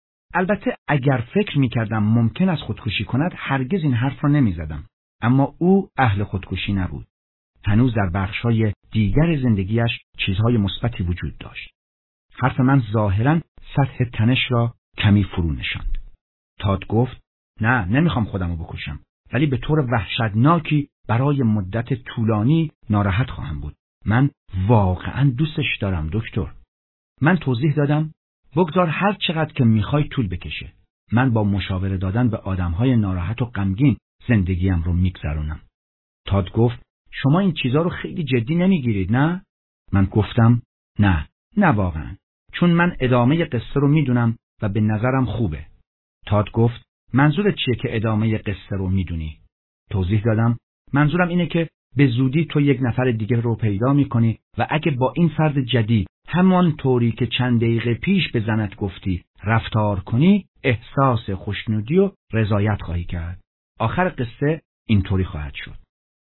البته اگر فکر میکردم ممکن است خودکشی کند هرگز این حرف را نمیزدم. اما او اهل خودکشی نبود. هنوز در بخش‌های دیگر زندگیش چیزهای مثبتی وجود داشت. حرف من ظاهراً سطح تنش را کمی فرو نشاند. تاد گفت نه نمیخوام خودمو بکشم، ولی به طور وحشتناکی برای مدت طولانی ناراحت خواهم بود. من واقعاً دوستش دارم دکتر. من توضیح دادم بگذار هر چقدر که میخوای طول بکشه. من با مشاوره دادن به آدمهای ناراحت و غمگین زندگیم رو میگذرونم. تاد گفت شما این چیزا رو خیلی جدی نمیگیرید نه؟ من گفتم نه، نه واقعا. چون من ادامه قصه رو میدونم و به نظرم خوبه. تاد گفت منظورت چیه که ادامه قصه رو میدونی؟ توضیح دادم منظورم اینه که به زودی تو یک نفر دیگه رو پیدا میکنی و اگه با این فرد جدید همان طوری که چند دقیقه پیش به زنت گفتی رفتار کنی، احساس خوشنودی و رضایت خواهی کرد. آخر قصه اینطوری خواهد شد.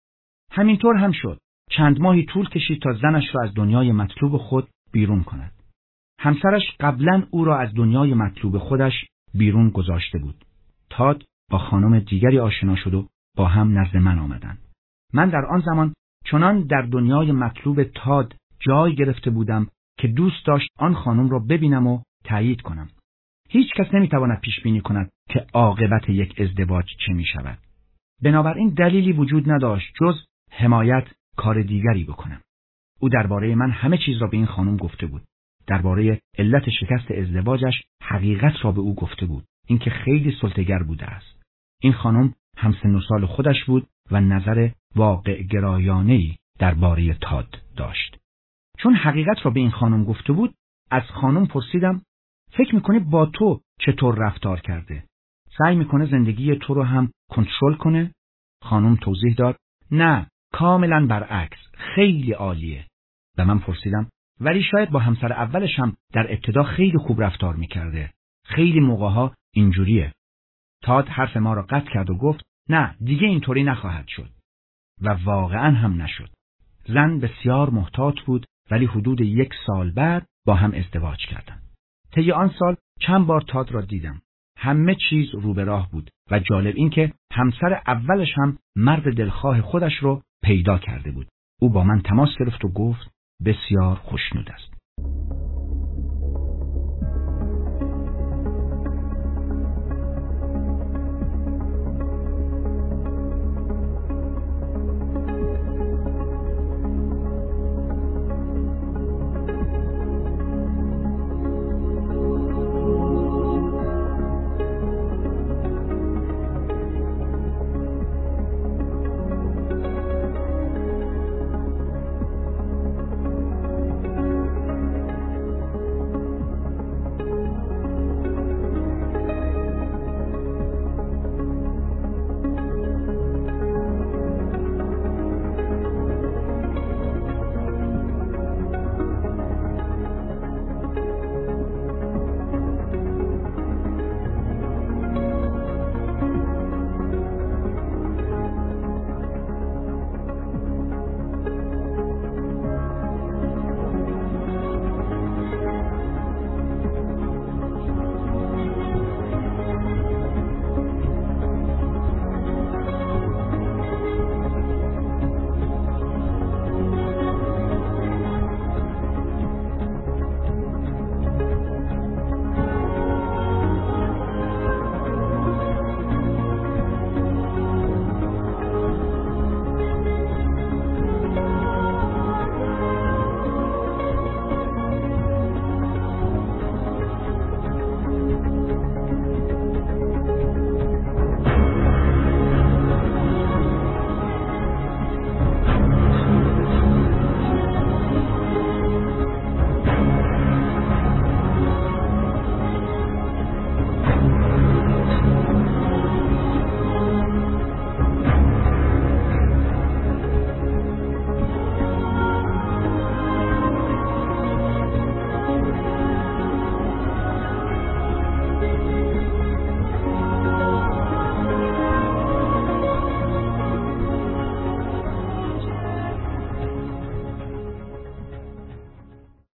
همینطور هم شد. چند ماهی طول کشید تا زنش را از دنیای مطلوب خود بیرون کند. همسرش قبلا او را از دنیای مطلوب خودش بیرون گذاشته بود. تاد با خانم دیگری آشنا شد و با هم نزد من آمدند. من در آن زمان چنان در دنیای مطلوب تاد جای گرفته بودم که دوست داشت آن خانم را ببینم و تایید کنم. هیچ کس نمیتواند پیش بینی کند که عاقبت یک ازدواج چه می شود. بنابراین دلیلی وجود نداشت جز حمایت کار دیگری بکنم. او درباره من همه چیز را به این خانم گفته بود. درباره علت شکست ازدواجش حقیقت را به او گفته بود. اینکه خیلی سلطه‌گر بوده است. این خانم همسن و سال خودش بود و نظر واقع گرایانه‌ای درباره تاد داشت. چون حقیقت را به این خانم گفته بود، از خانم پرسیدم فکر میکنه با تو چطور رفتار کرده؟ سعی میکنه زندگی تو رو هم کنترل کنه؟ خانم توضیح داد نه، کاملا برعکس، خیلی عالیه. و من پرسیدم ولی شاید با همسر اولش هم در ابتدا خیلی خوب رفتار میکرده. خیلی موقعها اینجوریه. تاد حرف ما را قطع کرد و گفت نه، دیگه اینطوری نخواهد شد. و واقعا هم نشد. زن بسیار محتاط بود، ولی حدود یک سال بعد با هم ازدواج کردند. طی آن سال چند بار تاد را دیدم. همه چیز رو به راه بود و جالب این که همسر اولش هم مرد دلخواه خودش رو پیدا کرده بود. او با من تماس گرفت و گفت بسیار خوشنود است.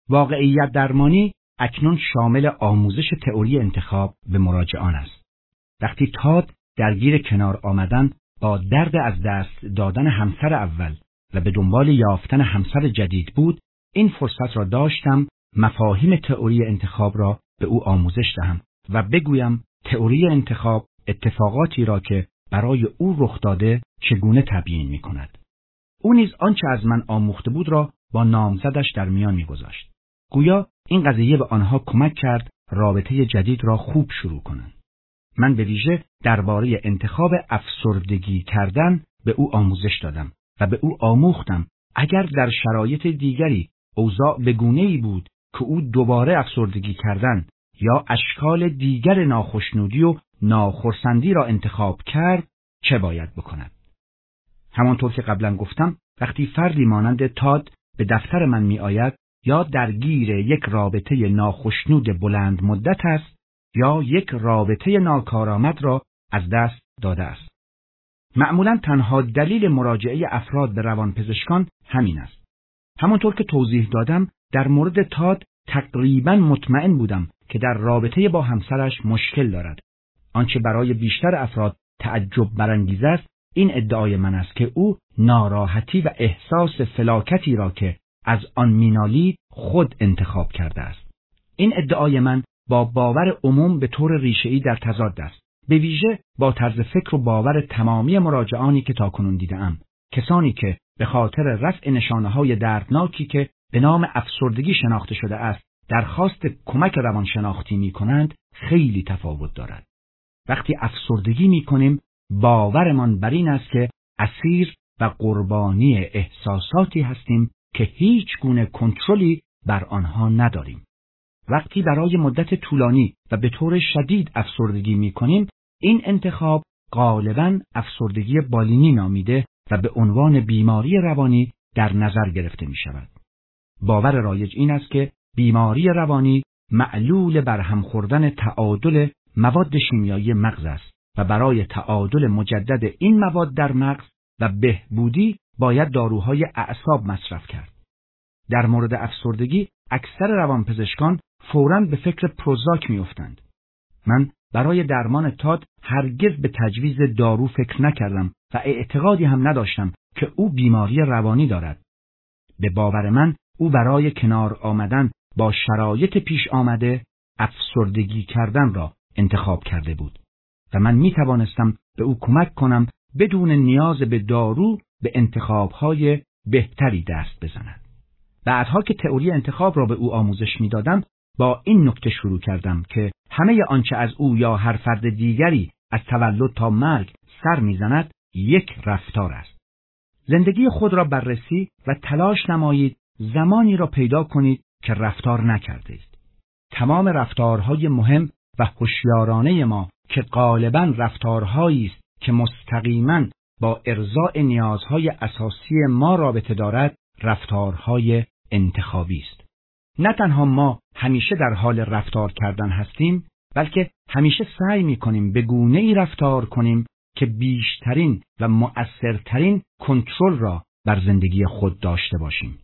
واقعیت درمانی اکنون شامل آموزش تئوری انتخاب به مراجعان است. وقتی تاد درگیر کنار آمدن با درد از دست دادن همسر اول و به دنبال یافتن همسر جدید بود، این فرصت را داشتم مفاهیم تئوری انتخاب را به او آموزش دهم و بگویم تئوری انتخاب اتفاقاتی را که برای او رخ داده چگونه تبیین می کند. او نیز آنچه از من آموخته بود را با نامزدش در میان می گذاشت. گویا این قضیه به آنها کمک کرد رابطه جدید را خوب شروع کنند. من به ویژه درباره انتخاب افسردگی کردن به او آموزش دادم و به او آموختم اگر در شرایط دیگری اوضاع به گونه‌ای بود که او دوباره افسردگی کردن یا اشکال دیگر ناخشنودی و ناخرسندی را انتخاب کرد چه باید بکند. همانطور که قبلا گفتم، وقتی فردی مانند تاد به دفتر من می آید یا درگیر یک رابطه ناخشنود بلند مدت است یا یک رابطه ناکارآمد را از دست داده است. معمولا تنها دلیل مراجعه افراد به روانپزشکان همین است. همانطور که توضیح دادم، در مورد تاد تقریبا مطمئن بودم که در رابطه با همسرش مشکل دارد. آنچه برای بیشتر افراد تعجب برانگیز است، این ادعای من است که او ناراحتی و احساس فلاکتی را که از آن مینالید خود انتخاب کرده است. این ادعای من با باور عموم به طور ریشه‌ای در تضاد است، به ویژه با طرز فکر و باور تمامی مراجعانی که تاکنون دیده‌ام. کسانی که به خاطر رفع نشانه‌های دردناکی که به نام افسردگی شناخته شده است درخواست کمک روانشناختی می‌کنند خیلی تفاوت دارد. وقتی افسردگی می‌کنیم باورمان بر این است که اسیر و قربانی احساساتی هستیم که هیچ گونه کنترلی بر آنها نداریم. وقتی برای مدت طولانی و به طور شدید افسردگی می‌کنیم، این انتخاب غالباً افسردگی بالینی نامیده و به عنوان بیماری روانی در نظر گرفته می‌شود. باور رایج این است که بیماری روانی معلول برهم خوردن تعادل مواد شیمیایی مغز است و برای تعادل مجدد این مواد در مغز و بهبودی باید داروهای اعصاب مصرف کرد. در مورد افسردگی اکثر روانپزشکان فوراً به فکر پروزاک می‌افتند. من برای درمان تاد هرگز به تجویز دارو فکر نکردم و اعتقادی هم نداشتم که او بیماری روانی دارد. به باور من او برای کنار آمدن با شرایط پیش آمده افسردگی کردن را انتخاب کرده بود و من می توانستم به او کمک کنم بدون نیاز به دارو به انتخاب‌های بهتری دست بزند. بعدها که تئوری انتخاب را به او آموزش می دادم، با این نکته شروع کردم که همه آنچه از او یا هر فرد دیگری از تولد تا مرگ سر می‌زند یک رفتار است. زندگی خود را بررسی و تلاش نمایید زمانی را پیدا کنید که رفتار نکرده اید. تمام رفتارهای مهم و هوشیارانه ما که غالباً رفتارهایی است که مستقیماً با ارضاء نیازهای اساسی ما رابطه دارد، رفتارهای انتخابی است. نه تنها ما همیشه در حال رفتار کردن هستیم، بلکه همیشه سعی می‌کنیم به گونه‌ای رفتار کنیم که بیشترین و مؤثرترین کنترل را بر زندگی خود داشته باشیم.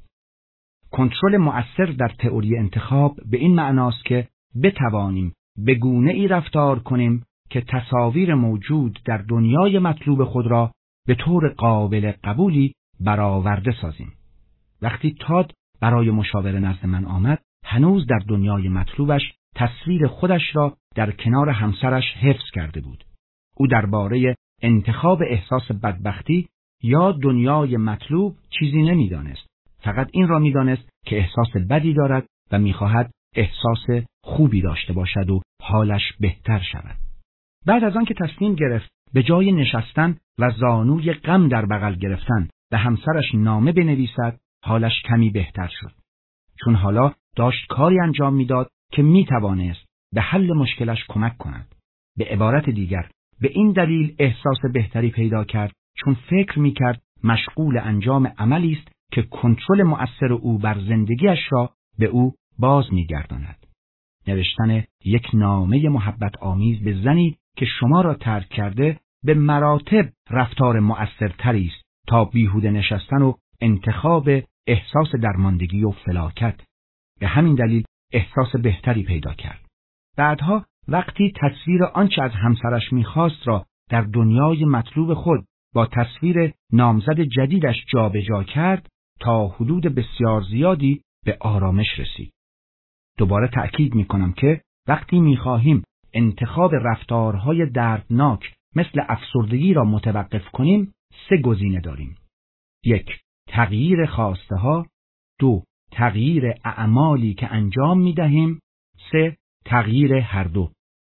کنترل مؤثر در تئوری انتخاب به این معناست که بتوانیم به گونه‌ای رفتار کنیم که تصاویر موجود در دنیای مطلوب خود را به طور قابل قبولی برآورده سازیم. وقتی تاد برای مشاوره نزد من آمد، هنوز در دنیای مطلوبش تصویر خودش را در کنار همسرش حفظ کرده بود. او درباره انتخاب احساس بدبختی یا دنیای مطلوب چیزی نمی‌دانست. فقط این را می‌دانست که احساس بدی دارد و می‌خواهد احساس خوبی داشته باشد و حالش بهتر شود. بعد از آن که تصمیم گرفت به جای نشستن و زانوی غم در بغل گرفتن به همسرش نامه بنویسد، حالش کمی بهتر شد. چون حالا داشت کاری انجام میداد که میتوانست به حل مشکلش کمک کند. به عبارت دیگر، به این دلیل احساس بهتری پیدا کرد چون فکر میکرد مشغول انجام عملی است که کنترل مؤثر او بر زندگیش را به او باز میگرداند. نوشتن یک نامه محبت آمیز به زنی که شما را ترک کرده به مراتب رفتار مؤثرتری است تا بیهوده نشستن و انتخاب احساس درماندگی و فلاکت. به همین دلیل احساس بهتری پیدا کرد. بعدها وقتی تصویر آنچه از همسرش می‌خواست را در دنیای مطلوب خود با تصویر نامزد جدیدش جابجا کرد، تا حدود بسیار زیادی به آرامش رسید. دوباره تأکید می‌کنم که وقتی می‌خواهیم انتخاب رفتارهای دردناک مثل افسردگی را متوقف کنیم، سه گزینه داریم. یک، تغییر خواسته ها. دو، تغییر اعمالی که انجام می‌دهیم. سه، تغییر هر دو.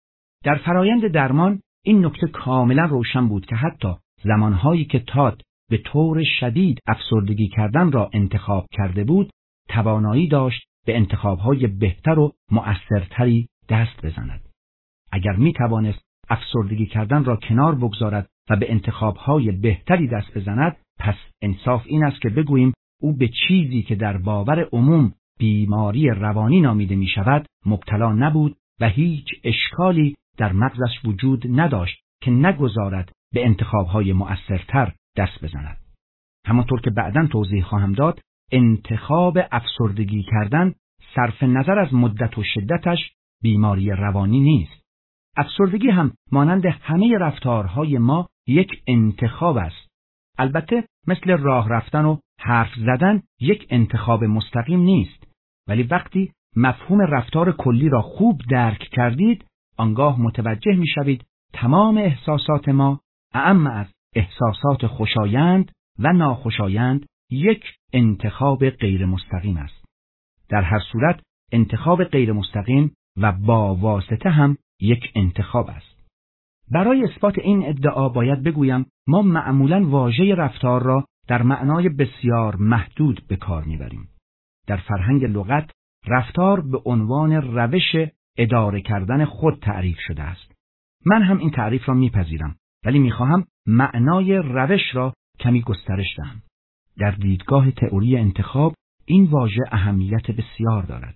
در فرایند درمان این نکته کاملا روشن بود که حتی زمانهایی که تاد به طور شدید افسردگی کردن را انتخاب کرده بود، توانایی داشت به انتخابهای بهتر و مؤثرتری دست بزند. اگر می توانست افسردگی کردن را کنار بگذارد و به انتخابهای بهتری دست بزند، پس انصاف این است که بگوییم او به چیزی که در باور عموم بیماری روانی نامیده می شود مبتلا نبود و هیچ اشکالی در مغزش وجود نداشت که نگذارد به انتخابهای مؤثرتر دست بزند. همانطور که بعداً توضیح خواهم داد، انتخاب افسردگی کردن صرف نظر از مدت و شدتش بیماری روانی نیست. افسردگی هم مانند همه رفتارهای ما یک انتخاب است. البته مثل راه رفتن و حرف زدن یک انتخاب مستقیم نیست، ولی وقتی مفهوم رفتار کلی را خوب درک کردید، آنگاه متوجه می شوید تمام احساسات ما، اعم از احساسات خوشایند و ناخوشایند، یک انتخاب غیر مستقیم است. در هر صورت انتخاب غیر مستقیم و با واسطه هم یک انتخاب است. برای اثبات این ادعا باید بگویم ما معمولاً واژه رفتار را در معنای بسیار محدود به کار میبریم. در فرهنگ لغت رفتار به عنوان روش اداره کردن خود تعریف شده است. من هم این تعریف را میپذیرم، ولی میخواهم معنای روش را کمی گسترش دهم. در دیدگاه تئوری انتخاب این واژه اهمیت بسیار دارد.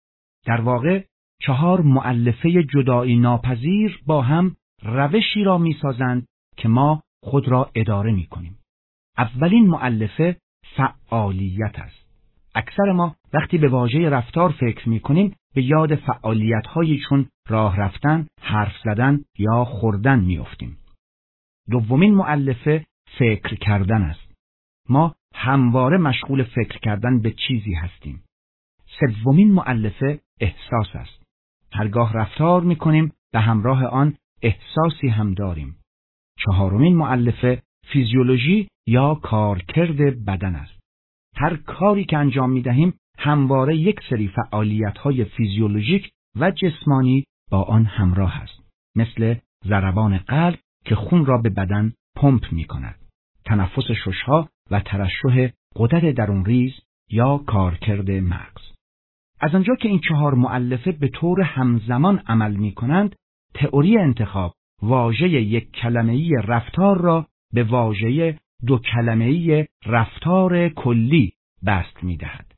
در واقع چهار مؤلفه جدایی ناپذیر با هم روشی را میسازند که ما خود را اداره میکنیم. اولین مؤلفه فعالیت است. اکثر ما وقتی به واژه رفتار فکر میکنیم به یاد فعالیت‌هایی چون راه رفتن، حرف زدن یا خوردن میافتیم. دومین مؤلفه فکر کردن است. ما همواره مشغول فکر کردن به چیزی هستیم. سومین مؤلفه احساس است. هرگاه رفتار میکنیم به همراه آن احساسی هم داریم. چهارمین مؤلفه فیزیولوژی یا کارکرد بدن است. هر کاری که انجام میدهیم همواره یک سری فعالیت‌های فیزیولوژیک و جسمانی با آن همراه است، مثل ضربان قلب که خون را به بدن پمپ می‌کند، تنفس شش‌ها و ترشح غدد درونریز یا کارکرد مغز. از آنجا که این چهار مؤلفه به طور همزمان عمل می‌کنند، تئوری انتخاب واژه یک کلمه‌ای رفتار را به واژه دو کلمه‌ای رفتار کلی بست می‌دهد.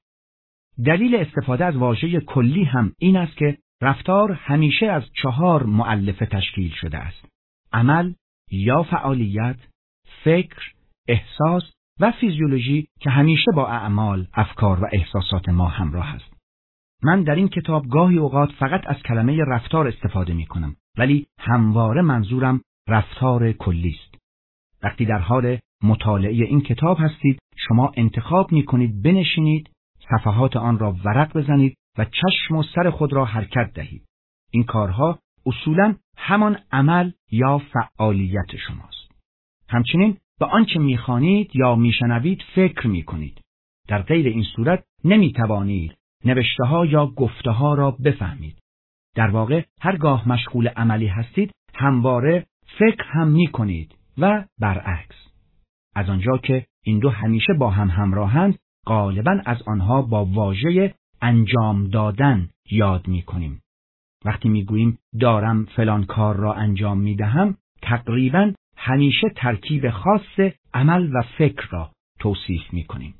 دلیل استفاده از واژه کلی هم این است که رفتار همیشه از چهار مؤلفه تشکیل شده است: عمل یا فعالیت، فکر، احساس و فیزیولوژی که همیشه با اعمال، افکار و احساسات ما همراه است. من در این کتاب گاهی اوقات فقط از کلمه رفتار استفاده می کنم، ولی همواره منظورم رفتار کلی است. وقتی در حال مطالعه این کتاب هستید، شما انتخاب می کنید بنشینید، صفحات آن را ورق بزنید و چشم و سر خود را حرکت دهید. این کارها اصولاً همان عمل یا فعالیت شماست. همچنین به آنچه می‌خوانید یا میشنوید فکر می‌کنید. در غیر این صورت نمی‌توانید نوشته‌ها یا گفته‌ها را بفهمید. در واقع هرگاه مشغول عملی هستید همواره فکر هم می‌کنید و برعکس. از آنجا که این دو همیشه با هم همراهند، غالباً از آنها با واژه انجام دادن یاد می‌کنیم. وقتی می‌گوییم دارم فلان کار را انجام می‌دهم، تقریباً همیشه ترکیب خاص عمل و فکر را توصیف می‌کنیم.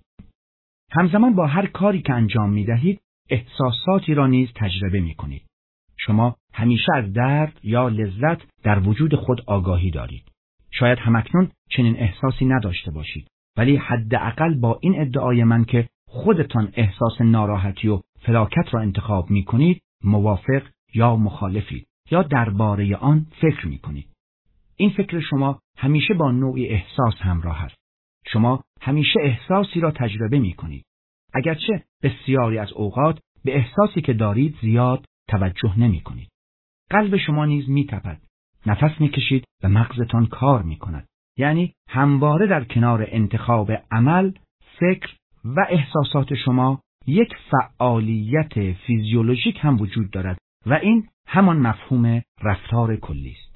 همزمان با هر کاری که انجام می‌دهید، احساساتی را نیز تجربه می‌کنید. شما همیشه از درد یا لذت در وجود خود آگاهی دارید. شاید همکنون چنین احساسی نداشته باشید، ولی حداقل با این ادعای من که خودتان احساس ناراحتی و فلاکت را انتخاب می کنید موافق یا مخالفید یا درباره آن فکر می کنید. این فکر شما همیشه با نوعی احساس همراه است. شما همیشه احساسی را تجربه می کنید. اگرچه بسیاری از اوقات به احساسی که دارید زیاد توجه نمی کنید. قلب شما نیز می تپد. نفس می کشید و مغزتان کار می کند. یعنی همواره در کنار انتخاب عمل، فکر و احساسات شما یک فعالیت فیزیولوژیک هم وجود دارد و این همان مفهوم رفتار کلی است.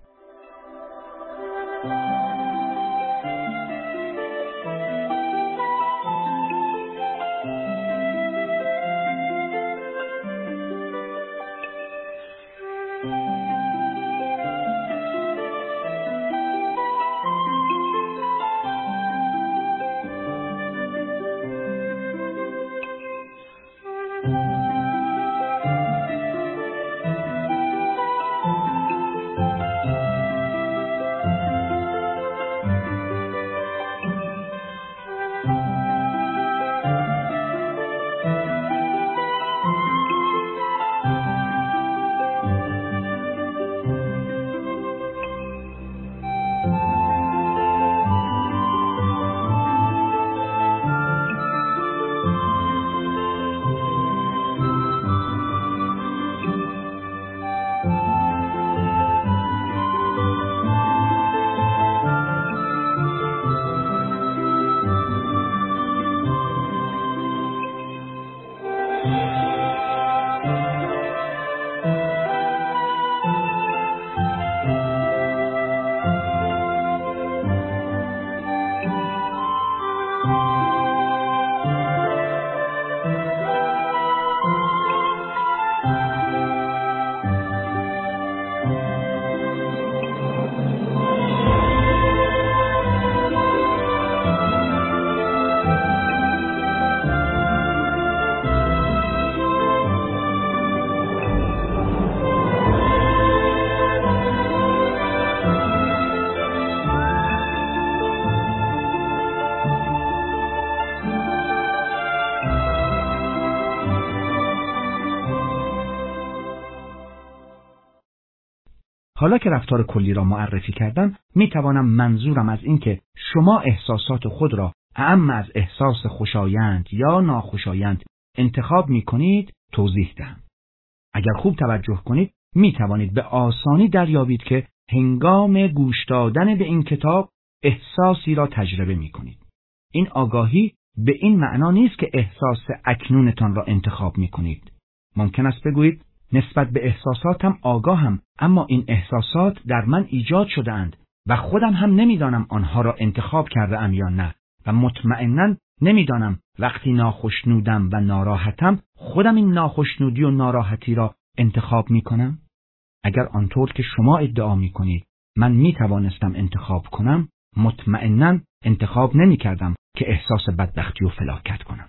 حالا که رفتار کلی را معرفی کردم، می توانم منظورم از این که شما احساسات خود را اعم از احساس خوشایند یا ناخوشایند انتخاب می کنید توضیح دهم. اگر خوب توجه کنید می توانید به آسانی دریابید که هنگام گوش دادن به این کتاب احساسی را تجربه می کنید. این آگاهی به این معنا نیست که احساس اکنونتان را انتخاب می کنید. ممکن است بگویید نسبت به احساساتم آگاهم، اما این احساسات در من ایجاد شده اند و خودم هم نمیدانم آنها را انتخاب کرده ام یا نه و مطمئناً نمیدانم وقتی ناخشنودم و ناراحتم خودم این ناخشنودی و ناراحتی را انتخاب می کنم. اگر آنطور که شما ادعا می کنید من می توانستم انتخاب کنم، مطمئناً انتخاب نمی کردم که احساس بدبختی و فلاکت کنم.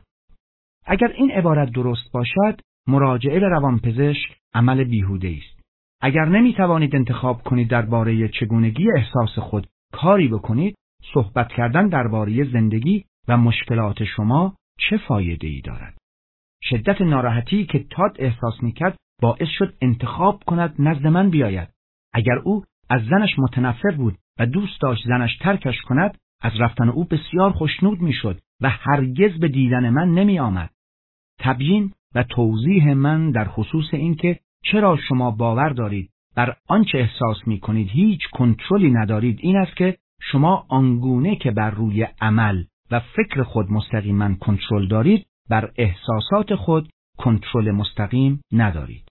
اگر این عبارت درست باشد، مراجعه به روانپزشک عمل بیهوده است. اگر نمی توانید انتخاب کنید درباره چگونگی احساس خود کاری بکنید، صحبت کردن درباره زندگی و مشکلات شما چه فایده ای دارد؟ شدت ناراحتی که تاد احساس میکرد باعث شد انتخاب کند نزد من بیاید. اگر او از زنش متنفر بود و دوست داشت زنش ترکش کند، از رفتن او بسیار خوشنود میشد و هرگز به دیدن من نمی آمد. تبیین و توضیح من در خصوص این که چرا شما باور دارید بر آنچه احساس می کنید هیچ کنترلی ندارید این است که شما آنگونه که بر روی عمل و فکر خود مستقیما کنترل دارید، بر احساسات خود کنترل مستقیم ندارید.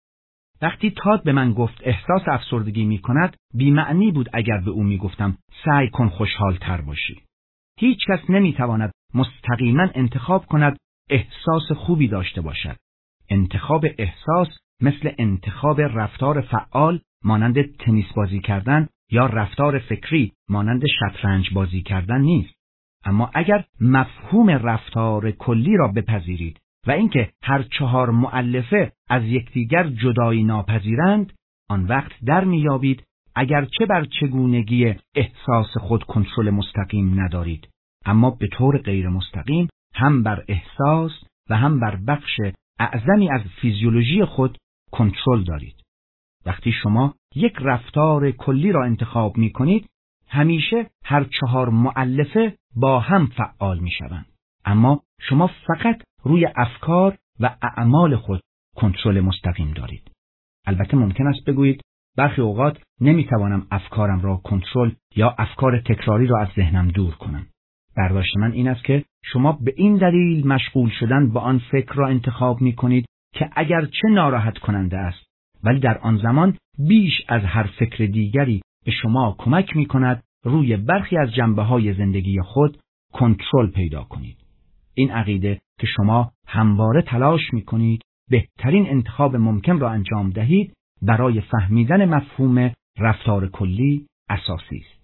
وقتی تاد به من گفت احساس افسردگی می کند، بی معنی بود اگر به او می گفتم سعی کن خوشحال تر باشی. هیچ کس نمی تواند مستقیما انتخاب کند احساس خوبی داشته باشد. انتخاب احساس مثل انتخاب رفتار فعال مانند تنیس بازی کردن یا رفتار فکری مانند شطرنج بازی کردن نیست. اما اگر مفهوم رفتار کلی را بپذیرید و اینکه هر چهار مؤلفه از یکدیگر جدایی ناپذیرند، آن وقت در میابید اگرچه بر چگونگی احساس خود کنترل مستقیم ندارید، اما به طور غیر مستقیم هم بر احساس و هم بر بخش اعظمی از فیزیولوژی خود کنترل دارید. وقتی شما یک رفتار کلی را انتخاب می کنید، همیشه هر چهار مؤلفه با هم فعال می شوند. اما شما فقط روی افکار و اعمال خود کنترل مستقیم دارید. البته ممکن است بگویید برخی اوقات نمی توانم افکارم را کنترل یا افکار تکراری را از ذهنم دور کنم. برداشت من این است که شما به این دلیل مشغول شدن با آن فکر را انتخاب می کنید که اگرچه ناراحت کننده است، ولی در آن زمان بیش از هر فکر دیگری به شما کمک می کند روی برخی از جنبه‌های زندگی خود کنترل پیدا کنید. این عقیده که شما همواره تلاش می کنید بهترین انتخاب ممکن را انجام دهید برای فهمیدن مفهوم رفتار کلی اساسی است.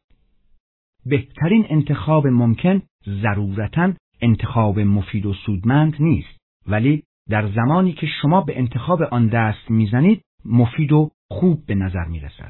بهترین انتخاب ممکن ضرورتاً انتخاب مفید و سودمند نیست، ولی در زمانی که شما به انتخاب آن دست میزنید مفید و خوب به نظر میرسد.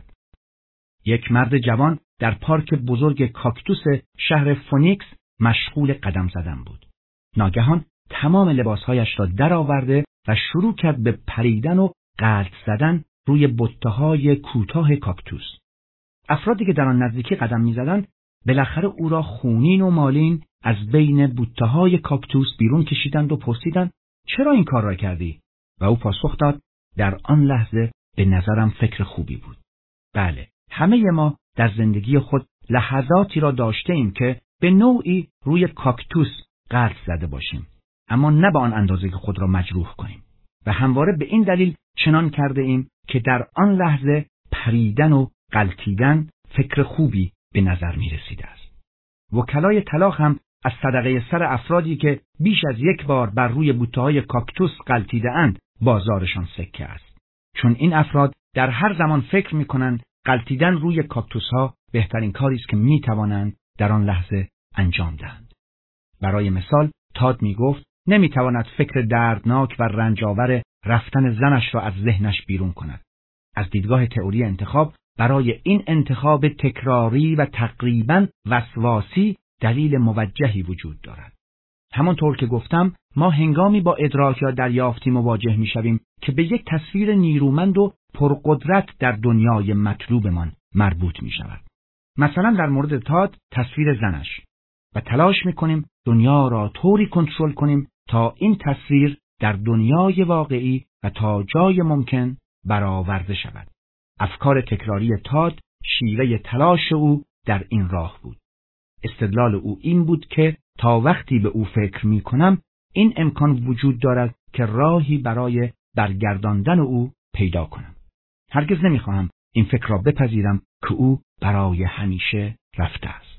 یک مرد جوان در پارک بزرگ کاکتوس شهر فونیکس مشغول قدم زدن بود. ناگهان تمام لباسهایش را درآورده و شروع کرد به پریدن و غلط زدن روی بته‌های کوتاه کاکتوس. افرادی که در آن نزدیکی قدم می‌زدند بالاخره او را خونین و مالین از بین بوته‌های کاکتوس بیرون کشیدند و پرسیدند چرا این کار را کردی؟ و او پاسخ داد در آن لحظه به نظرم فکر خوبی بود. بله، همه ما در زندگی خود لحظاتی را داشته ایم که به نوعی روی کاکتوس غلط زده باشیم، اما نه به آن اندازه که خود را مجروح کنیم و همواره به این دلیل چنان کرده ایم که در آن لحظه پریدن و غلطیدن فکر خوبی به نظر می رسیده است. وکلای طلاق هم از صدقه سر افرادی که بیش از یک بار بر روی بوته‌های کاکتوس غلطیده اند بازارشان سکه است، چون این افراد در هر زمان فکر می کنند غلطیدن روی کاکتوس ها بهترین کاری است که می توانند در آن لحظه انجام دهند. برای مثال تاد می گفت نمی تواند فکر دردناک و رنجاور رفتن زنش را از ذهنش بیرون کند. از دیدگاه تئوری انتخاب برای این انتخاب تکراری و تقریباً وسواسی دلیل موجهی وجود دارد. همانطور که گفتم ما هنگامی با ادراک یا دریافتی مواجه می شویم که به یک تصویر نیرومند و پرقدرت در دنیای مطلوبمان مربوط می شود. مثلا در مورد تاد تصویر زنش و تلاش می کنیم دنیا را طوری کنترل کنیم تا این تصویر در دنیای واقعی و تا جای ممکن برآورده شود. افکار تکراری تاد شیوه تلاش او در این راه بود. استدلال او این بود که تا وقتی به او فکر می کنم این امکان وجود دارد که راهی برای برگرداندن او پیدا کنم. هرگز نمی خواهم این فکر را بپذیرم که او برای همیشه رفته است.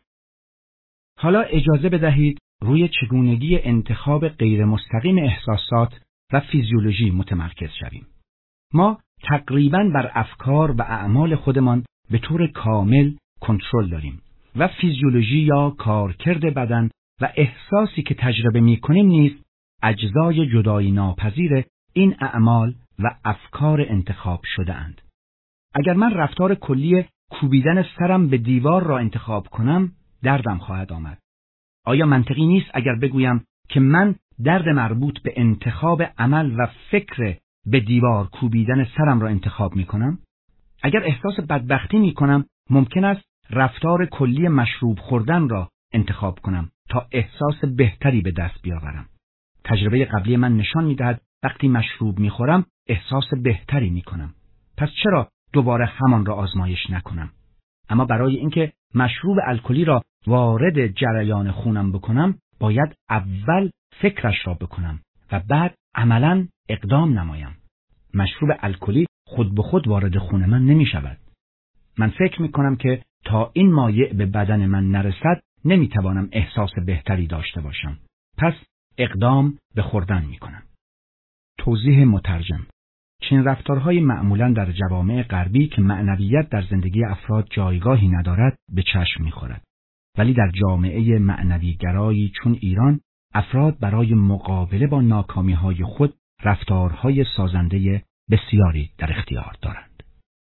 حالا اجازه بدهید روی چگونگی انتخاب غیر مستقیم احساسات و فیزیولوژی متمرکز شویم. ما تقریباً بر افکار و اعمال خودمان به طور کامل کنترل داریم و فیزیولوژی یا کارکرد بدن و احساسی که تجربه می کنیم نیز اجزای جدایی ناپذیر این اعمال و افکار انتخاب شده اند. اگر من رفتار کلی کوبیدن سرم به دیوار را انتخاب کنم، دردم خواهد آمد. آیا منطقی نیست اگر بگویم که من درد مربوط به انتخاب عمل و فکر به دیوار کوبیدن سرم را انتخاب می کنم؟ اگر احساس بدبختی می کنم، ممکن است رفتار کلی مشروب خوردن را انتخاب کنم تا احساس بهتری به دست بیاورم. تجربه قبلی من نشان می دهد وقتی مشروب می خورم احساس بهتری می کنم. پس چرا دوباره همان را آزمایش نکنم؟ اما برای اینکه مشروب الکلی را وارد جریان خونم بکنم، باید اول فکرش را بکنم و بعد عملاً اقدام نمایم. مشروب الکلی خود به خود وارد خون من نمی شود. من فکر می کنم که تا این مایع به بدن من نرسد نمی توانم احساس بهتری داشته باشم. پس اقدام به خوردن می کنم. توضیح مترجم: چنین رفتارهای معمولاً در جوامع غربی که معنویت در زندگی افراد جایگاهی ندارد به چشم می خورد. ولی در جامعه معنوی گرایی چون ایران، افراد برای مقابله با ناکامی‌های خود رفتارهای سازنده بسیاری در اختیار دارند.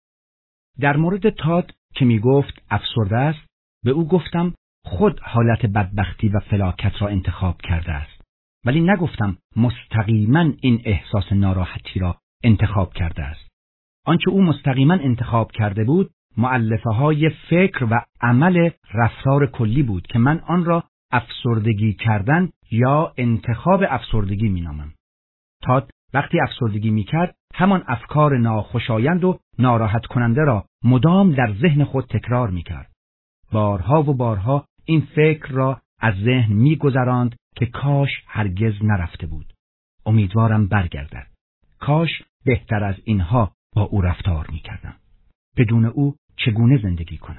در مورد تاد که می گفت افسرده است، به او گفتم خود حالت بدبختی و فلاکت را انتخاب کرده است. ولی نگفتم مستقیما این احساس ناراحتی را انتخاب کرده است. آنچه او مستقیما انتخاب کرده بود مؤلفه های فکر و عمل رفتار کلی بود که من آن را افسردگی کردن یا انتخاب افسردگی می نامم. تاد وقتی افسردگی می کرد همان افکار ناخوشایند و ناراحت کننده را مدام در ذهن خود تکرار می کرد. بارها و بارها این فکر را از ذهن می گذراند که کاش هرگز نرفته بود. امیدوارم برگردد. کاش بهتر از اینها با او رفتار می کردم. بدون او چگونه زندگی کنم؟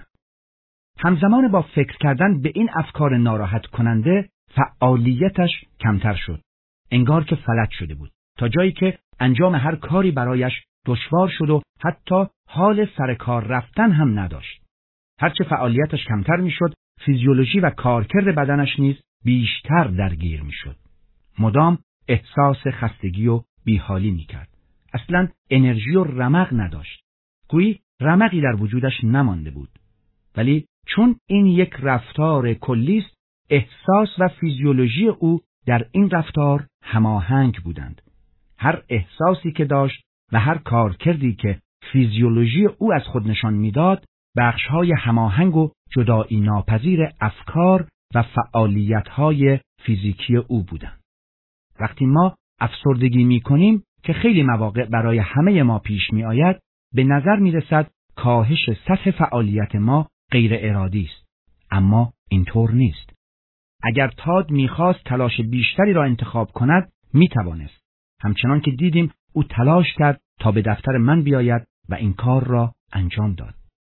همزمان با فکر کردن به این افکار ناراحت کننده فعالیتش کمتر شد. انگار که فلج شده بود. تا جایی که انجام هر کاری برایش دشوار شد و حتی حال سر کار رفتن هم نداشت. هرچه فعالیتش کمتر می شد، فیزیولوژی و کارکرد بدنش نیز بیشتر درگیر می شد. مدام احساس خستگی و بیحالی می کرد. اصلاً انرژی و رمق نداشت. گویی رمقی در وجودش نمانده بود. ولی چون این یک رفتار کلی است، احساس و فیزیولوژی او در این رفتار هماهنگ بودند. هر احساسی که داشت و هر کارکردی که فیزیولوژی او از خود نشان میداد، بخش‌های هماهنگ و جدایی ناپذیر افکار و فعالیت‌های فیزیکی او بودند. وقتی ما افسردگی می‌کنیم که خیلی مواقع برای همه ما پیش می‌آید، به نظر می‌رسد کاهش سطح فعالیت ما غیر ارادی است. اما اینطور نیست. اگر تاد می‌خواست تلاش بیشتری را انتخاب کند، می‌توانست. همچنان که دیدیم او تلاش کرد تا به دفتر من بیاید و این کار را انجام داد.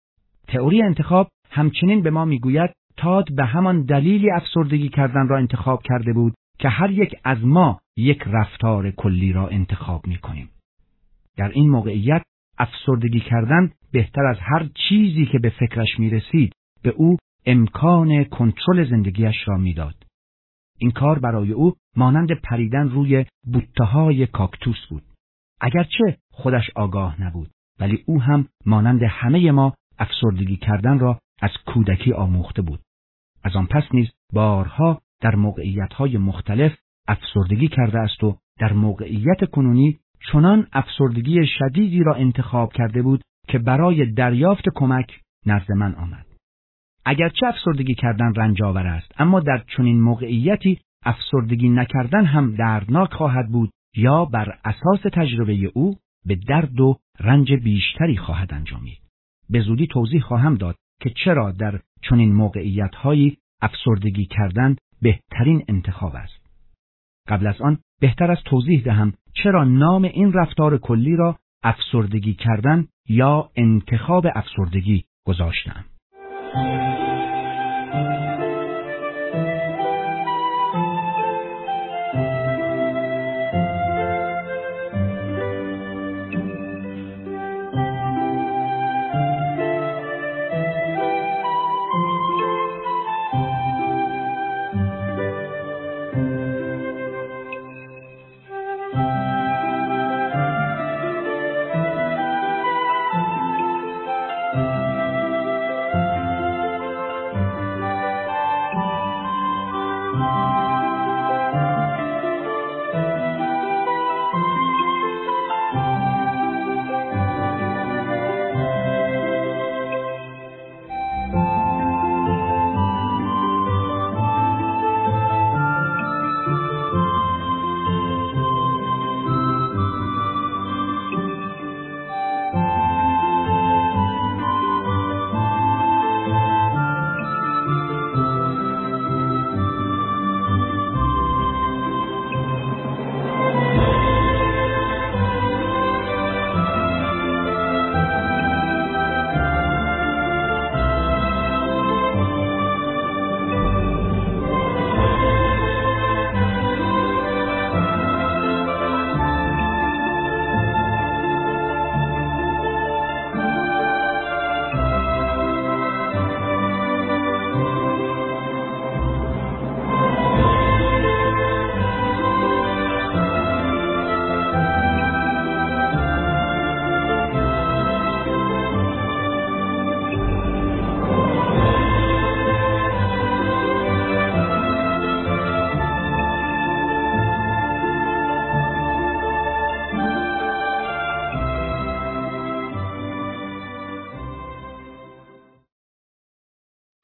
تئوری انتخاب همچنین به ما می‌گوید تاد به همان دلیلی افسردگی کردن را انتخاب کرده بود که هر یک از ما یک رفتار کلی را انتخاب می‌کنیم. در این موقعیت افسردگی کردن بهتر از هر چیزی که به فکرش می‌رسید به او امکان کنترل زندگیش را می‌داد. این کار برای او مانند پریدن روی بوته‌های کاکتوس بود. اگرچه خودش آگاه نبود، ولی او هم مانند همه ما افسردگی کردن را از کودکی آموخته بود. از آن پس نیز بارها در موقعیت‌های مختلف افسردگی کرده است و در موقعیت کنونی چنان افسردگی شدیدی را انتخاب کرده بود که برای دریافت کمک نزد من آمد. اگرچه افسردگی کردن رنج‌آور است، اما در چنین موقعیتی افسردگی نکردن هم دردناک خواهد بود یا بر اساس تجربه او به درد و رنج بیشتری خواهد انجامید. به زودی توضیح خواهم داد که چرا در چنین موقعیت‌هایی افسردگی کردن بهترین انتخاب است. قبل از آن بهتر است توضیح دهم چرا نام این رفتار کلی را افسردگی کردن یا انتخاب افسردگی گذاشتم.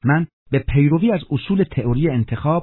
من به پیروی از اصول تئوری انتخاب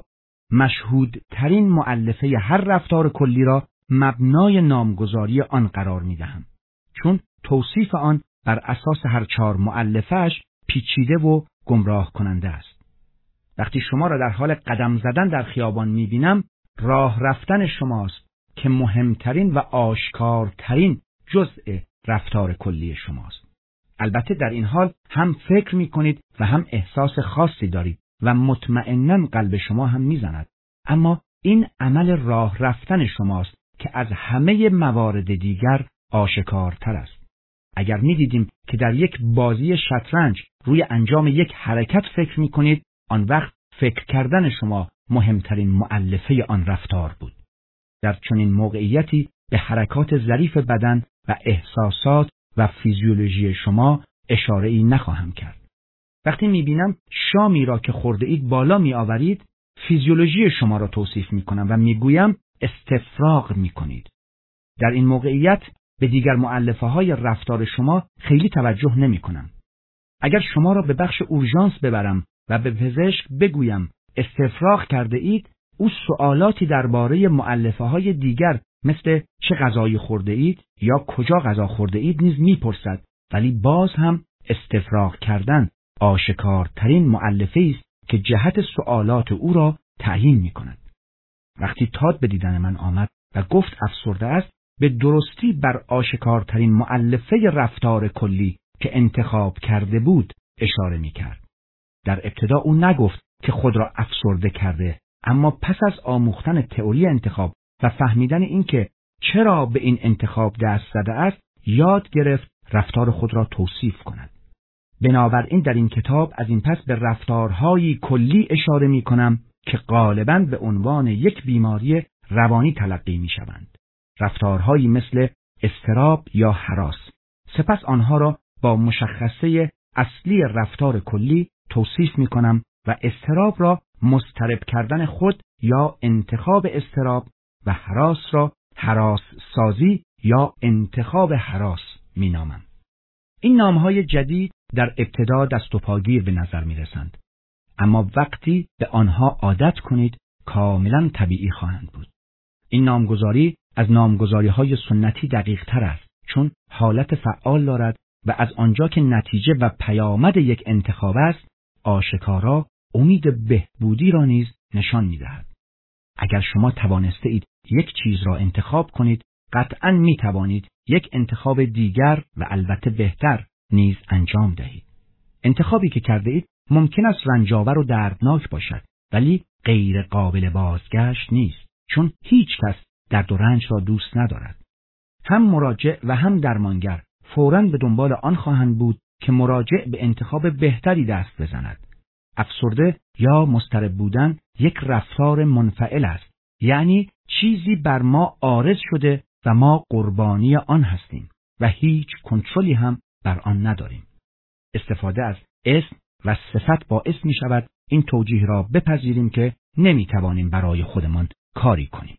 مشهودترین مؤلفه هر رفتار کلی را مبنای نامگذاری آن قرار می دهم، چون توصیف آن بر اساس هر چهار مؤلفه‌اش پیچیده و گمراه کننده است. وقتی شما را در حال قدم زدن در خیابان می بینم، راه رفتن شماست که مهمترین و آشکارترین جزء رفتار کلی شماست. البته در این حال هم فکر می کنید و هم احساس خاصی دارید و مطمئناً قلب شما هم می زند. اما این عمل راه رفتن شماست که از همه موارد دیگر آشکارتر است. اگر می دیدیم که در یک بازی شطرنج روی انجام یک حرکت فکر می کنید، آن وقت فکر کردن شما مهمترین مؤلفه آن رفتار بود. در چنین موقعیتی به حرکات ظریف بدن و احساسات و فیزیولوژی شما اشاره ای نخواهم کرد. وقتی میبینم شامی را که خورده اید بالا می آورید، فیزیولوژی شما را توصیف می کنم و میگویم استفراغ می کنید. در این موقعیت به دیگر مؤلفه های رفتار شما خیلی توجه نمی کنم. اگر شما را به بخش اورژانس ببرم و به پزشک بگویم استفراغ کرده اید، او سوالاتی درباره مؤلفه های دیگر مثل چه غذایی خورده اید یا کجا غذا خورده اید نیز میپرسد، ولی باز هم استفراغ کردن آشکارترین مؤلفه است که جهت سوالات او را تعیین میکند. وقتی تاد به دیدن من آمد و گفت افسرده است، به درستی بر آشکارترین مؤلفه رفتار کلی که انتخاب کرده بود اشاره میکرد. در ابتدا او نگفت که خود را افسرده کرده، اما پس از آموختن تئوری انتخاب و فهمیدن اینکه چرا به این انتخاب دست زده است، یاد گرفت رفتار خود را توصیف کند. بنابراین در این کتاب از این پس به رفتارهایی کلی اشاره می کنم که غالباً به عنوان یک بیماری روانی تلقی می شوند. رفتارهایی مثل اضطراب یا هراس. سپس آنها را با مشخصه اصلی رفتار کلی توصیف می کنم و اضطراب را مضطرب کردن خود یا انتخاب اضطراب و هراس را هراس سازی یا انتخاب هراس می نامم. این نامهای جدید در ابتدا دست و پاگیر به نظر می رسند، اما وقتی به آنها عادت کنید کاملا طبیعی خواهند بود. این نامگذاری از نامگذاری های سنتی دقیق تر است، چون حالت فعال دارد و از آنجا که نتیجه و پیامد یک انتخاب است، آشکارا امید بهبودی را نیز نشان می دهد. اگر شما توانسته اید یک چیز را انتخاب کنید، قطعاً می توانید یک انتخاب دیگر و البته بهتر نیز انجام دهید. انتخابی که کرده اید ممکن است رنجاور و دردناک باشد، ولی غیر قابل بازگشت نیست، چون هیچ کس درد و رنج را دوست ندارد. هم مراجع و هم درمانگر فوراً به دنبال آن خواهند بود که مراجع به انتخاب بهتری دست بزند. افسرده یا مضطرب بودن یک رفتار منفعل است، یعنی چیزی بر ما عارض شده و ما قربانی آن هستیم و هیچ کنترلی هم بر آن نداریم. استفاده از اسم و صفت باعث می شود این توجیه را بپذیریم که نمی توانیم برای خودمان کاری کنیم.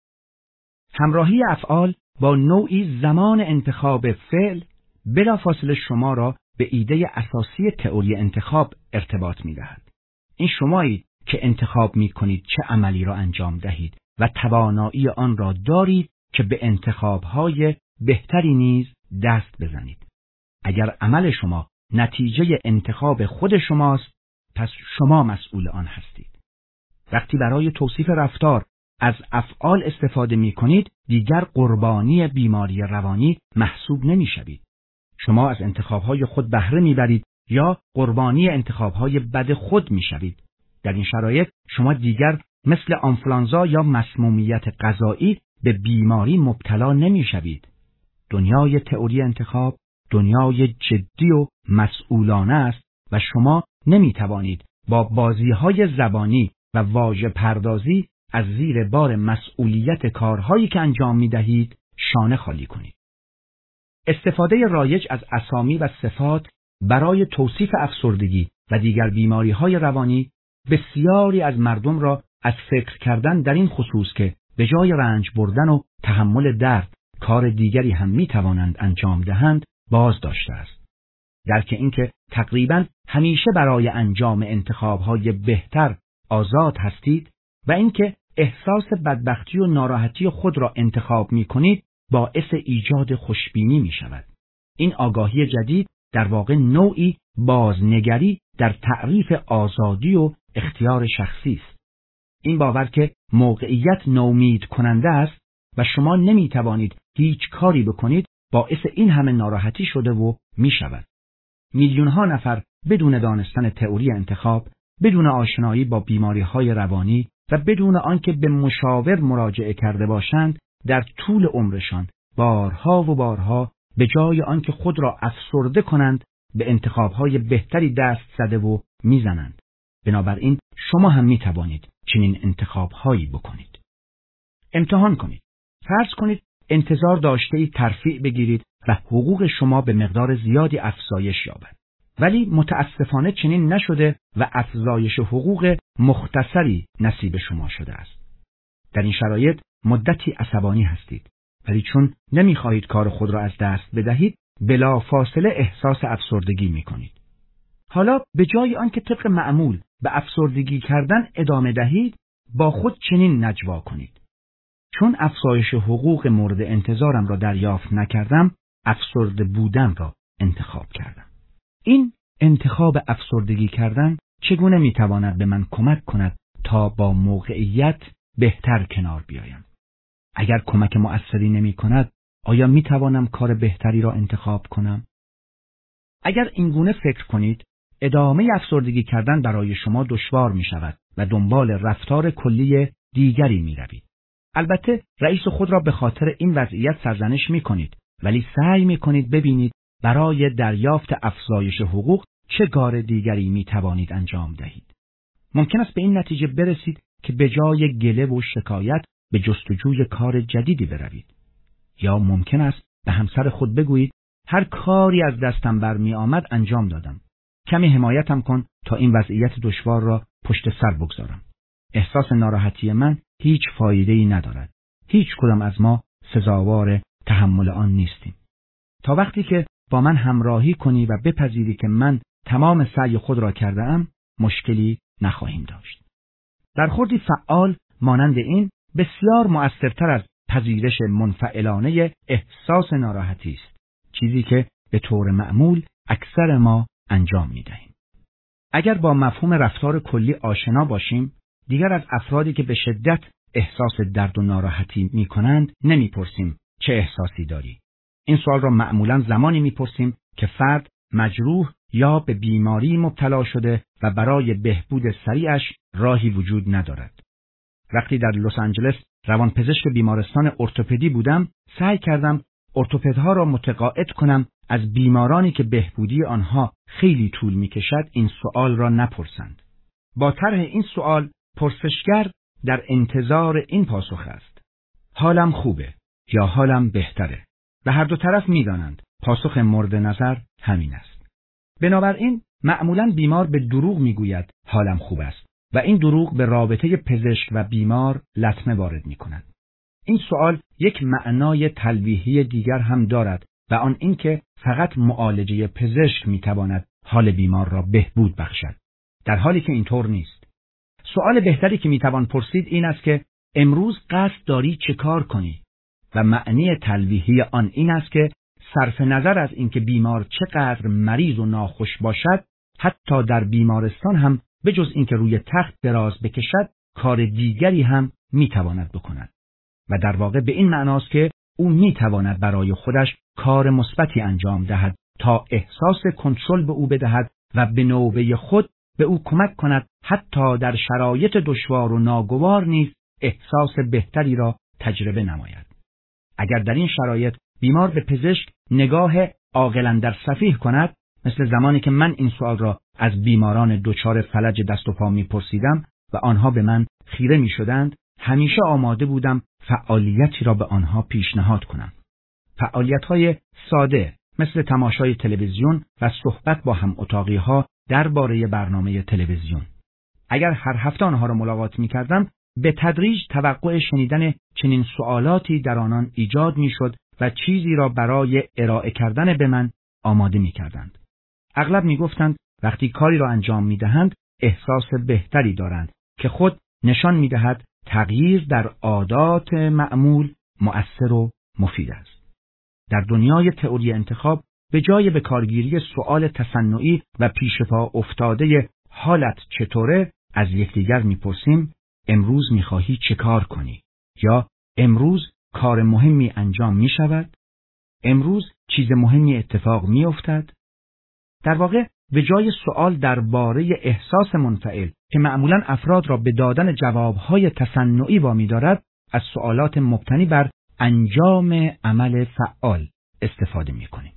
همراهی افعال با نوعی زمان انتخاب فعل بلافاصله شما را به ایده اساسی تئوری انتخاب ارتباط می دهد. این شمایید که انتخاب می کنید چه عملی را انجام دهید و توانایی آن را دارید که به انتخاب‌های بهتری نیز دست بزنید. اگر عمل شما نتیجه انتخاب خود شماست، پس شما مسئول آن هستید. وقتی برای توصیف رفتار از افعال استفاده می کنید، دیگر قربانی بیماری روانی محسوب نمی شوید. شما از انتخاب‌های خود بهره می‌برید یا قربانی انتخاب‌های بد خود می‌شوید. در این شرایط شما دیگر مثل آنفولانزا یا مسمومیت غذایی به بیماری مبتلا نمی‌شوید. دنیای تئوری انتخاب دنیای جدی و مسئولانه است و شما نمی‌توانید با بازی‌های زبانی و واژه پردازی از زیر بار مسئولیت کارهایی که انجام می‌دهید شانه خالی کنید. استفاده رایج از اسامی و صفات برای توصیف افسردگی و دیگر بیماری‌های روانی بسیاری از مردم را از فکر کردن در این خصوص که به جای رنج بردن و تحمل درد کار دیگری هم می‌توانند انجام دهند باز داشته است. درک اینکه تقریباً همیشه برای انجام انتخاب‌های بهتر آزاد هستید و اینکه احساس بدبختی و ناراحتی خود را انتخاب می‌کنید باعث ایجاد خوشبینی می‌شود. این آگاهی جدید در واقع نوعی بازنگری در تعریف آزادی و اختیار شخصی است. این باور که موقعیت نومید کننده است و شما نمی‌توانید هیچ کاری بکنید باعث این همه ناراحتی شده و می‌شود. میلیون‌ها نفر بدون دانستن تئوری انتخاب، بدون آشنایی با بیماری‌های روانی و بدون آنکه به مشاور مراجعه کرده باشند، در طول عمرشان بارها و بارها به جای آنکه خود را افسرده کنند، به انتخاب‌های بهتری دست زده و می‌زنند. بنابراین شما هم می‌توانید چنین انتخاب‌هایی بکنید. امتحان کنید. فرض کنید انتظار داشته‌اید ترفیع بگیرید و حقوق شما به مقدار زیادی افزایش یابد. ولی متاسفانه چنین نشده و افزایش حقوق مختصری نصیب شما شده است. در این شرایط مدتی عصبانی هستید، ولی چون نمی‌خواهید کار خود را از دست بدهید، بلافاصله احساس افسردگی می‌کنید. حالا به جای آنکه طبق معمول به افسردگی کردن ادامه دهید، با خود چنین نجوا کنید: چون افزایش حقوق مورد انتظارم را دریافت نکردم، افسرده بودن را انتخاب کردم. این انتخاب افسردگی کردن چگونه میتواند به من کمک کند تا با موقعیت بهتر کنار بیایم؟ اگر کمک مؤثری نمی کند، آیا میتوانم کار بهتری را انتخاب کنم؟ اگر اینگونه فکر کنید، ادامه افسردگی کردن برای شما دشوار می شود و دنبال رفتار کلی دیگری می روید. البته رئیس خود را به خاطر این وضعیت سرزنش می کنید، ولی سعی می کنید ببینید برای دریافت افزایش حقوق چه کار دیگری می توانید انجام دهید. ممکن است به این نتیجه برسید که به جای گله و شکایت به جستجوی کار جدیدی بروید. یا ممکن است به همسر خود بگویید هر کاری از دستم برمی آمد انجام دادم. کمی حمایتم کن تا این وضعیت دشوار را پشت سر بگذارم. احساس ناراحتی من هیچ فایده‌ای ندارد. هیچ کدام از ما سزاوار تحمل آن نیستیم. تا وقتی که با من همراهی کنی و بپذیری که من تمام سعی خود را کرده ام، مشکلی نخواهیم داشت. برخوردی فعال مانند این بسیار مؤثرتر از پذیرش منفعلانه احساس ناراحتی است، چیزی که به طور معمول اکثر ما انجام می‌دهیم. اگر با مفهوم رفتار کلی آشنا باشیم، دیگر از افرادی که به شدت احساس درد و ناراحتی می‌کنند نمی‌پرسیم چه احساسی داری. این سوال را معمولاً زمانی می‌پرسیم که فرد مجروح یا به بیماری مبتلا شده و برای بهبود سریعش راهی وجود ندارد. وقتی در لس آنجلس روانپزشک بیمارستان ارتوپدی بودم، سعی کردم ارتوپدها را متقاعد کنم از بیمارانی که بهبودی آنها خیلی طول می‌کشد این سوال را نپرسند. با طرح این سوال، پرسشگر در انتظار این پاسخ است: حالم خوبه یا حالم بهتره؟ و هر دو طرف می‌دانند پاسخ مورد نظر همین است. بنابراین معمولاً بیمار به دروغ می‌گوید حالم خوب است و این دروغ به رابطه پزشک و بیمار لطمه وارد می‌کند. این سوال یک معنای تلویحی دیگر هم دارد و آن اینکه فقط معالجه پزشک می‌تواند حال بیمار را بهبود بخشد، در حالی که اینطور نیست. سوال بهتری که می‌توان پرسید این است که امروز قصد داری چه کار کنی؟ و معنی تلویحی آن این است که صرف نظر از اینکه بیمار چقدر مریض و ناخوش باشد، حتی در بیمارستان هم به جز اینکه روی تخت دراز بکشد، کار دیگری هم می‌تواند بکند. و در واقع به این معناست که او می‌تواند برای خودش کار مثبتی انجام دهد تا احساس کنترل به او بدهد و به نوبه خود به او کمک کند حتی در شرایط دشوار و ناگوار نیز احساس بهتری را تجربه نماید. اگر در این شرایط بیمار به پزشک نگاه عاقلاً در سفیه کند، مثل زمانی که من این سوال را از بیماران دچار فلج دست و پا می‌پرسیدم و آنها به من خیره می‌شدند، همیشه آماده بودم فعالیتی را به آنها پیشنهاد کنم. فعالیت‌های ساده مثل تماشای تلویزیون و صحبت با هم اتاقی‌ها درباره برنامه تلویزیون. اگر هر هفته آنها را ملاقات می‌کردم، به تدریج توقع شنیدن چنین سوالاتی در آنان ایجاد می‌شد و چیزی را برای ارائه کردن به من آماده می‌کردند. اغلب میگفتند وقتی کاری را انجام میدهند احساس بهتری دارند که خود نشان میدهد تغییر در عادات معمول مؤثر و مفید است. در دنیای تئوری انتخاب به جای به کارگیری سؤال تصنعی و پیش پا افتاده حالت چطوره از یکدیگر میپرسیم امروز میخواهی چه کار کنی؟ یا امروز کار مهمی انجام میشود؟ امروز چیز مهمی اتفاق میافتد؟ در واقع به جای سؤال درباره احساس منفعل که معمولاً افراد را به دادن جوابهای تصنعی وامی دارد، از سؤالات مبتنی بر انجام عمل فعال استفاده میکنیم.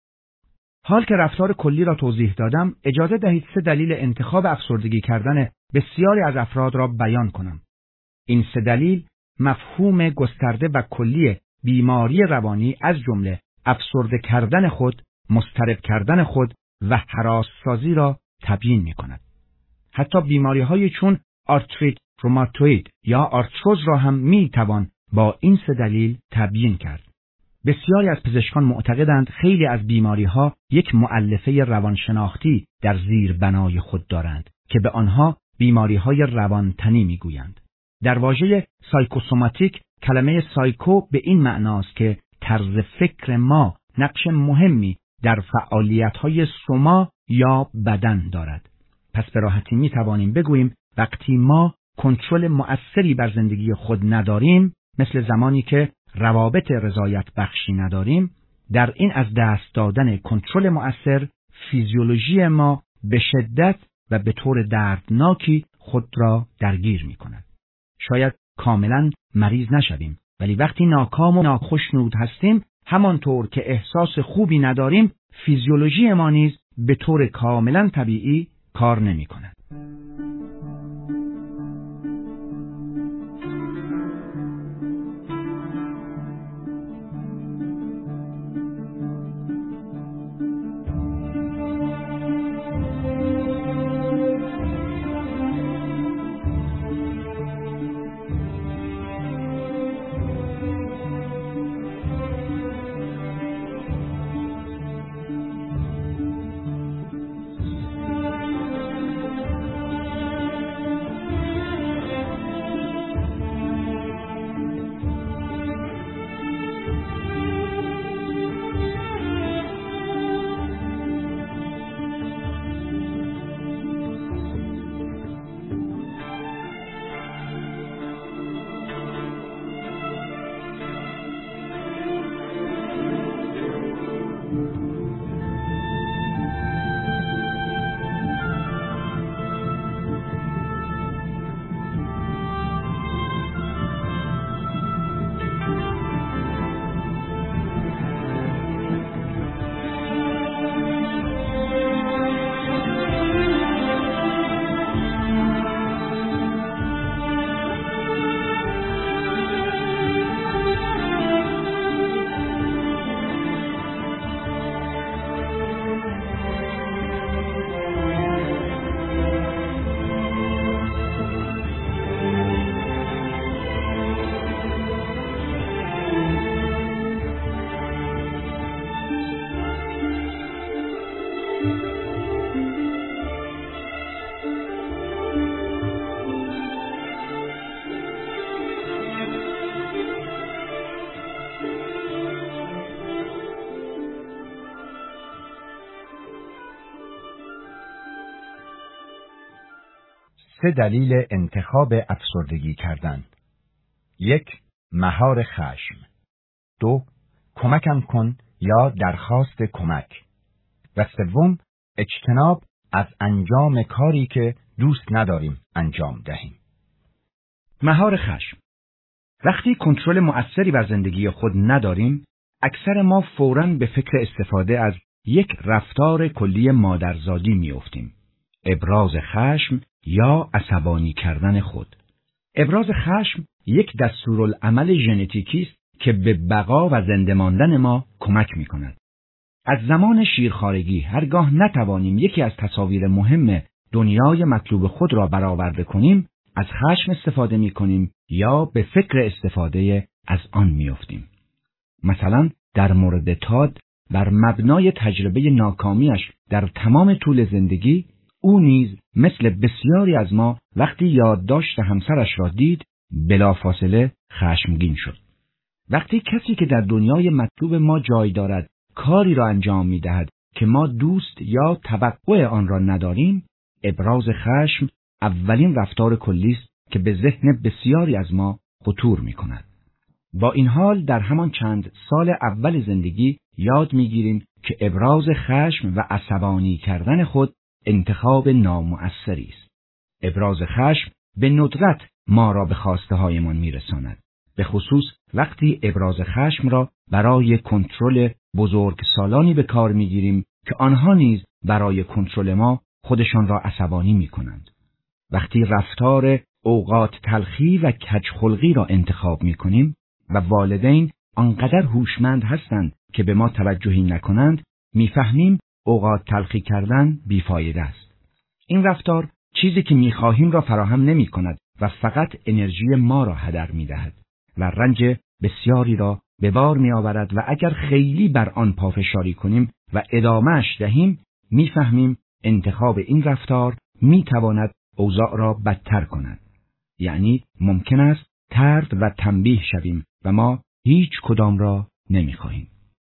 حال که رفتار کلی را توضیح دادم، اجازه دهید سه دلیل انتخاب افسردگی کردن بسیاری از افراد را بیان کنم. این سه دلیل مفهوم گسترده و کلی بیماری روانی از جمله افسرده کردن خود، مضطرب کردن خود و هراس‌سازی را تبیین می‌کند. حتی بیماری‌های چون آرتریت روماتوئید یا آرتروز را هم می‌توان با این سه دلیل تبیین کرد. بسیاری از پزشکان معتقدند خیلی از بیماری‌ها یک مؤلفه روانشناختی در زیر بنای خود دارند که به آنها بیماری‌های روانتنی می‌گویند. در واژه سایکوسوماتیک کلمه سایکو به این معناست که طرز فکر ما نقش مهمی در فعالیت‌های سوما یا بدن دارد. پس به راحتی می‌توانیم بگوییم وقتی ما کنترل مؤثری بر زندگی خود نداریم، مثل زمانی که روابط رضایت بخشی نداریم، در این از دست دادن کنترل مؤثر فیزیولوژی ما به شدت و به طور دردناکی خود را درگیر می‌کند. شاید کاملاً مریض نشویم، ولی وقتی ناکام و ناخشنود هستیم، همانطور که احساس خوبی نداریم، فیزیولوژی ما نیز به طور کاملاً طبیعی کار نمی‌کند. سه دلیل انتخاب افسردگی کردن. یک، مهار خشم. دو، کمکم کن یا درخواست کمک. و سوم، اجتناب از انجام کاری که دوست نداریم انجام دهیم. مهار خشم. وقتی کنترل مؤثری بر زندگی خود نداریم، اکثر ما فوراً به فکر استفاده از یک رفتار کلی مادرزادی میافتیم. ابراز خشم یا عصبانی کردن خود. ابراز خشم یک دستورالعمل ژنتیکی است که به بقا و زنده ماندن ما کمک می‌کند. از زمان شیرخوارگی هرگاه نتوانیم یکی از تصاویر مهم دنیای مطلوب خود را برآورده کنیم، از خشم استفاده می‌کنیم یا به فکر استفاده از آن می‌افتیم. مثلا در مورد تاد بر مبنای تجربه ناکامیش در تمام طول زندگی، او نیز مثل بسیاری از ما وقتی یادداشت همسرش را دید بلافاصله خشمگین شد. وقتی کسی که در دنیای مطلوب ما جای دارد کاری را انجام می دهد که ما دوست یا توقع آن را نداریم، ابراز خشم اولین رفتار کلی است که به ذهن بسیاری از ما خطور می کند. با این حال در همان چند سال اول زندگی یاد می گیریم که ابراز خشم و عصبانی کردن خود انتخاب نامؤثری است. ابراز خشم به ندرت ما را به خواسته هایمان می رساند. به خصوص وقتی ابراز خشم را برای کنترل بزرگسالانی به کار می گیریم که آنها نیز برای کنترل ما خودشان را عصبانی می کنند. وقتی رفتار اوقات تلخی و کجخلقی را انتخاب می کنیم و والدین آنقدر هوشمند هستند که به ما توجهی نکنند، میفهمیم اوقات تلخی کردن بیفایده است. این رفتار چیزی که میخواهیم را فراهم نمی کند و فقط انرژی ما را هدر می دهد و رنج بسیاری را به بار می آورد و اگر خیلی بر آن پافشاری کنیم و ادامهش دهیم، میفهمیم انتخاب این رفتار می تواند اوضاع را بدتر کند. یعنی ممکن است طرد و تنبیه شویم و ما هیچ کدام را نمی خواهیم.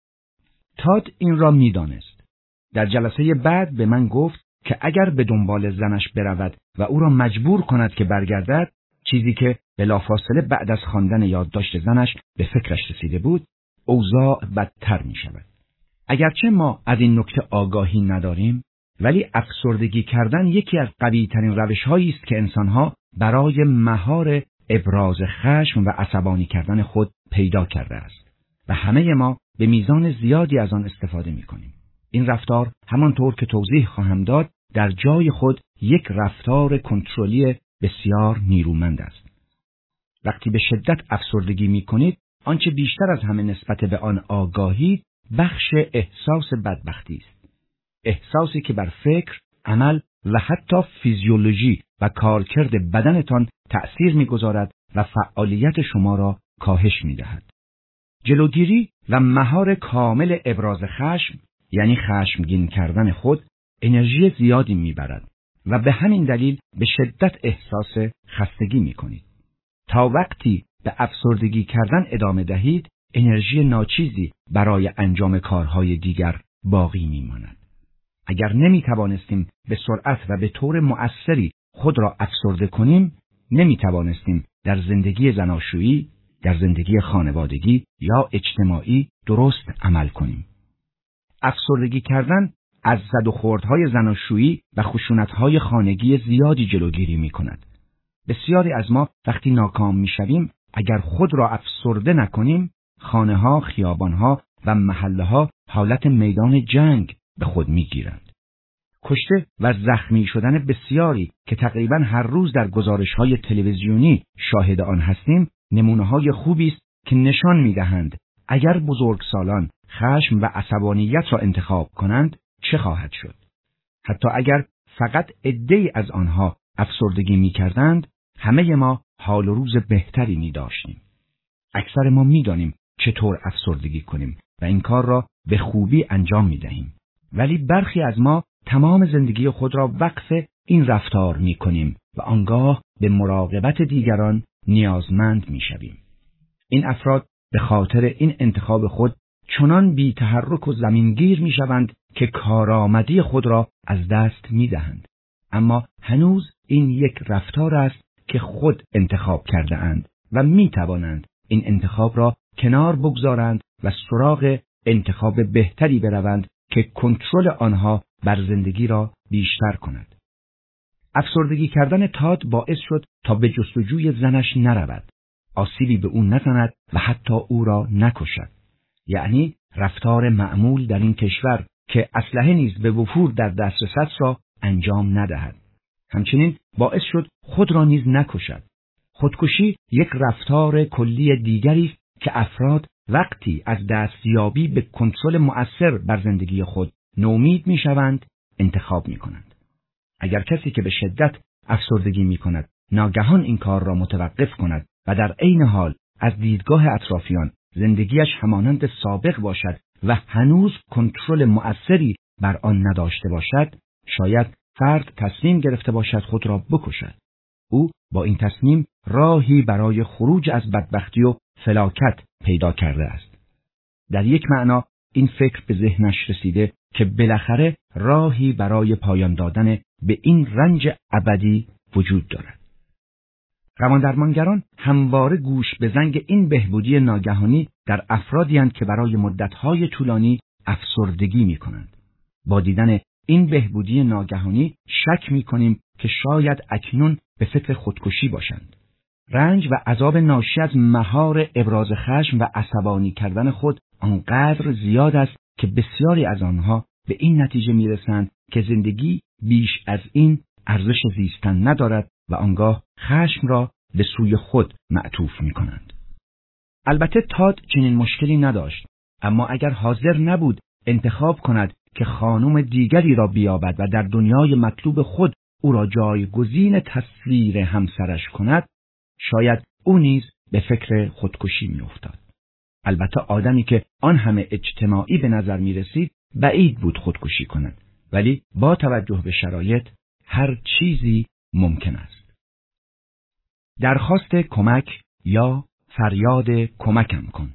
تاد این را می دانست. در جلسه بعد به من گفت که اگر به دنبال زنش برود و او را مجبور کند که برگردد، چیزی که بلافاصله بعد از خواندن یادداشت زنش به فکرش رسیده بود، اوضاع بدتر می شود. اگرچه ما از این نکته آگاهی نداریم، ولی افسردگی کردن یکی از قوی ترین روش هایی است که انسانها برای مهار ابراز خشم و عصبانی کردن خود پیدا کرده است و همه ما به میزان زیادی از آن استفاده می کنیم. این رفتار همانطور که توضیح خواهم داد در جای خود یک رفتار کنترلی بسیار نیرومند است. وقتی به شدت افسردگی می کنید، آنچه بیشتر از همه نسبت به آن آگاهی بخش احساس بدبختی است. احساسی که بر فکر، عمل و حتی فیزیولوژی و کارکرد بدنتان تأثیر می‌گذارد و فعالیت شما را کاهش می‌دهد. جلوگیری و مهار کامل ابراز خشم، یعنی خشمگین کردن خود، انرژی زیادی می‌برد و به همین دلیل به شدت احساس خستگی می‌کنید. تا وقتی به افسردگی کردن ادامه دهید، انرژی ناچیزی برای انجام کارهای دیگر باقی می‌ماند. اگر نمی توانستیم به سرعت و به طور مؤثری خود را افسرده کنیم، نمی توانستیم در زندگی زناشویی، در زندگی خانوادگی یا اجتماعی درست عمل کنیم. افسردگی کردن از زد و خوردهای زناشویی و خشونتهای خانگی زیادی جلوگیری می کند. بسیاری از ما وقتی ناکام می شویم، اگر خود را افسرده نکنیم، خانه ها، خیابان ها و محله ها حالت میدان جنگ به خود می گیرند. کشته و زخمی شدن بسیاری که تقریباً هر روز در گزارش‌های تلویزیونی شاهد آن هستیم، نمونه‌های خوبی است که نشان می‌دهند اگر بزرگسالان خشم و عصبانیت را انتخاب کنند چه خواهد شد. حتی اگر فقط عده‌ای از آنها افسردگی می‌کردند، همه ما حال و روز بهتری می‌داشتیم. اکثر ما می‌دانیم چطور افسردگی کنیم و این کار را به خوبی انجام می‌دهیم. ولی برخی از ما تمام زندگی خود را وقف این رفتار می کنیم و آنگاه به مراقبت دیگران نیازمند می شویم. این افراد به خاطر این انتخاب خود چنان بی تحرک و زمینگیر می شوند که کارآمدی خود را از دست می دهند. اما هنوز این یک رفتار است که خود انتخاب کرده اند و می توانند این انتخاب را کنار بگذارند و سراغ انتخاب بهتری بروند که کنترل آنها بر زندگی را بیشتر کند. افسردگی کردن تاد باعث شد تا به جستجوی زنش نرود، آسیبی به او نزند و حتی او را نکشد. یعنی رفتار معمول در این کشور که اسلحه نیز به وفور در دسترس را انجام ندهد. همچنین باعث شد خود را نیز نکشد. خودکشی یک رفتار کلی دیگری است که افراد وقتی از دستیابی به کنترل مؤثر بر زندگی خود نومید میشوند انتخاب میکنند. اگر کسی که به شدت افسردگی میکند ناگهان این کار را متوقف کند و در عین حال از دیدگاه اطرافیان زندگیش همانند سابق باشد و هنوز کنترل مؤثری بر آن نداشته باشد، شاید فرد تصمیم گرفته باشد خود را بکشد. او با این تصمیم راهی برای خروج از بدبختی و فلاکت پیدا کرده است. در یک معنا این فکر به ذهنش رسیده که بالاخره راهی برای پایان دادن به این رنج ابدی وجود دارد. روان‌درمانگران همواره گوش به زنگ این بهبودی ناگهانی در افرادی اند که برای مدت‌های طولانی افسردگی می‌کنند. با دیدن این بهبودی ناگهانی شک می‌کنیم که شاید اکنون به فکر خودکشی باشند. رنج و عذاب ناشی از مهار ابراز خشم و عصبانی کردن خود آنقدر زیاد است که بسیاری از آنها به این نتیجه می‌رسند که زندگی بیش از این ارزش زیستن ندارد و آنگاه خشم را به سوی خود معطوف می‌کنند. البته تاد چنین مشکلی نداشت، اما اگر حاضر نبود انتخاب کند که خانم دیگری را بیابد و در دنیای مطلوب خود او را جایگزین تصویر همسرش کند، شاید او نیز به فکر خودکشی می‌افتاد. البته آدمی که آن همه اجتماعی به نظر می‌رسید بعید بود خودکشی کند، ولی با توجه به شرایط هر چیزی ممکن است. درخواست کمک یا فریاد کمکم کن.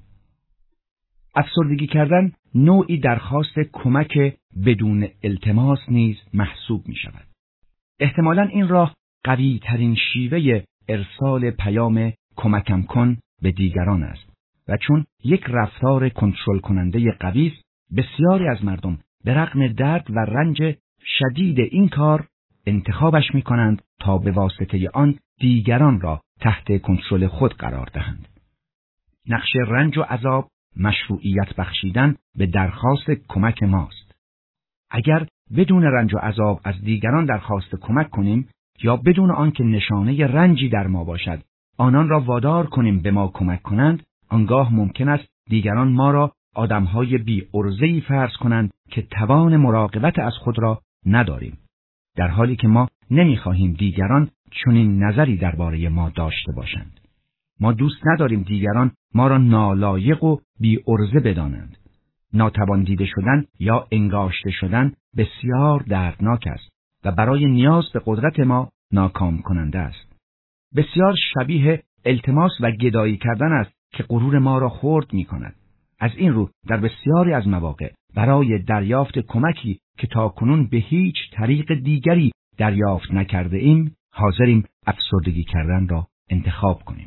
افسردگی کردن نوعی درخواست کمک بدون التماس نیز محسوب می شود. احتمالاً این راه قوی ترین شیوه ارسال پیام کمکم کن به دیگران است و چون یک رفتار کنترل کننده قوی است، بسیاری از مردم به رغم درد و رنج شدید این کار انتخابش می کنند تا به واسطه آن دیگران را تحت کنترل خود قرار دهند. نقش رنج و عذاب مشروعیت بخشیدن به درخواست کمک ماست. اگر بدون رنج و عذاب از دیگران درخواست کمک کنیم یا بدون آنکه نشانه رنجی در ما باشد آنان را وادار کنیم به ما کمک کنند، آنگاه ممکن است دیگران ما را آدمهای بی عرضه‌ای فرض کنند که توان مراقبت از خود را نداریم، در حالی که ما نمی‌خواهیم دیگران چنین نظری درباره ما داشته باشند. ما دوست نداریم دیگران ما را نالایق و بی عرضه بدانند. ناتوان دیده شدن یا انگاشته شدن بسیار دردناک است و برای نیاز به قدرت ما ناکام کننده است. بسیار شبیه التماس و گدایی کردن است که غرور ما را خرد می کند. از این رو در بسیاری از مواقع برای دریافت کمکی که تاکنون به هیچ طریق دیگری دریافت نکرده ایم، حاضریم افسردگی کردن را انتخاب کنیم.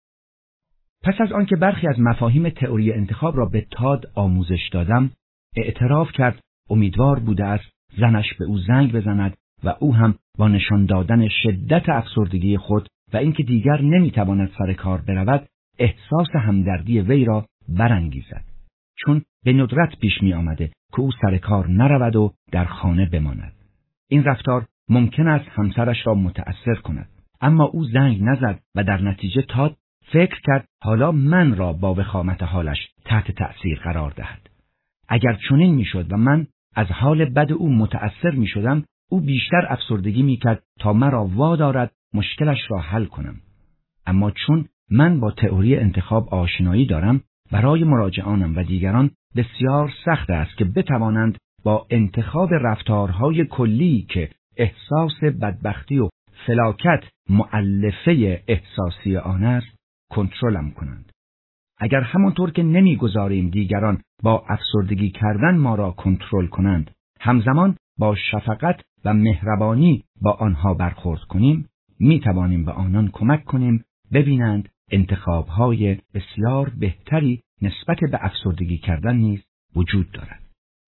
پس از آنکه برخی از مفاهیم تئوری انتخاب را به تاد آموزش دادم، اعتراف کرد امیدوار بوده است زنش به او زنگ بزند و او هم با نشان دادن شدت افسردگی خود و اینکه دیگر نمیتواند سر کار برود، احساس همدردی وی را برانگیزد، چون به ندرت پیش می آمده که او سر کار نرود و در خانه بماند. این رفتار ممکن است همسرش را متأثر کند، اما او زنگ نزد و در نتیجه تاد فکر کرد حالا من را با وخامت حالش تحت تأثیر قرار دهد. اگر چنین میشد و من از حال بد او متأثر می شدم، او بیشتر افسردگی می کرد تا مرا وادارد مشکلش را حل کنم. اما چون من با تئوری انتخاب آشنایی دارم، برای مراجعانم و دیگران بسیار سخت است که بتوانند با انتخاب رفتارهای کلی که احساس بدبختی و فلاکت مؤلفه احساسی آن است، کنترلم کنند. اگر همانطور که نمیگذاریم دیگران با افسردگی کردن ما را کنترل کنند، همزمان با شفقت و مهربانی با آنها برخورد کنیم، می توانیم به آنان کمک کنیم ببینند انتخاب‌های بسیار بهتری نسبت به افسردگی کردن نیز وجود دارد.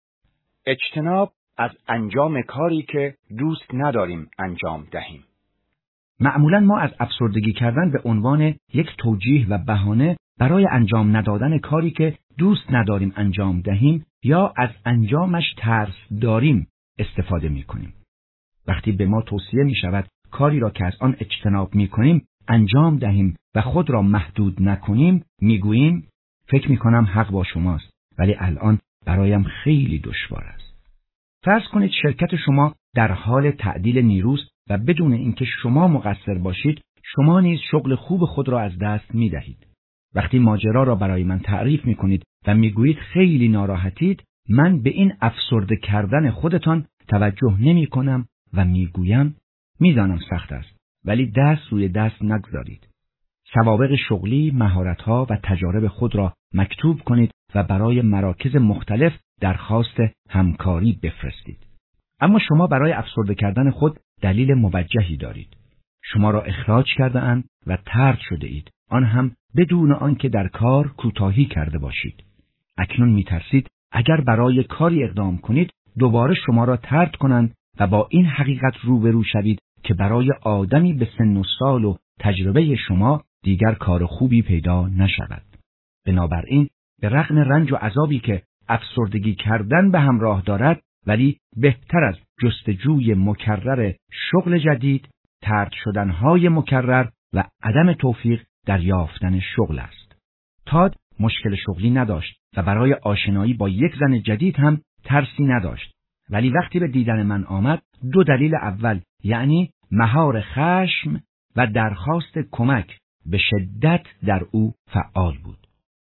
اجتناب از انجام کاری که دوست نداریم انجام دهیم. معمولاً ما از افسردگی کردن به عنوان یک توجیه و بهانه برای انجام ندادن کاری که دوست نداریم انجام دهیم یا از انجامش ترس داریم استفاده می کنیم. وقتی به ما توصیه می شود کاری را که از آن اجتناب می کنیم انجام دهیم و خود را محدود نکنیم، می گوییم فکر می کنم حق با شماست، ولی الان برایم خیلی دشوار است. فرض کنید شرکت شما در حال تعدیل نیروست و بدون اینکه شما مقصر باشید، شما نیز شغل خوب خود را از دست می دهید. وقتی ماجرا را برای من تعریف می‌کنید و می‌گویید خیلی ناراحتید، من به این افسرده کردن خودتان توجه نمی‌کنم و می‌گویم می‌دانم سخت است، ولی دست روی دست نگذارید. سوابق شغلی، مهارت‌ها و تجارب خود را مکتوب کنید و برای مراکز مختلف درخواست همکاری بفرستید. اما شما برای افسرده کردن خود دلیل موجهی دارید. شما را اخراج کرده اند و طرد شده اید، آن هم بدون آنکه در کار کوتاهی کرده باشید. اکنون می‌ترسید اگر برای کاری اقدام کنید دوباره شما را طرد کنند و با این حقیقت روبرو شوید که برای آدمی به سن و سال و تجربه شما دیگر کار خوبی پیدا نشود. بنابراین به رغم رنج و عذابی که افسردگی کردن به همراه دارد، ولی بهتر از جستجوی مکرر شغل جدید، طرد شدنهای مکرر و عدم توفیق در یافتن شغل است. تاد مشکل شغلی نداشت و برای آشنایی با یک زن جدید هم ترسی نداشت، ولی وقتی به دیدن من آمد دو دلیل اول، یعنی مهار خشم و درخواست کمک، به شدت در او فعال بود.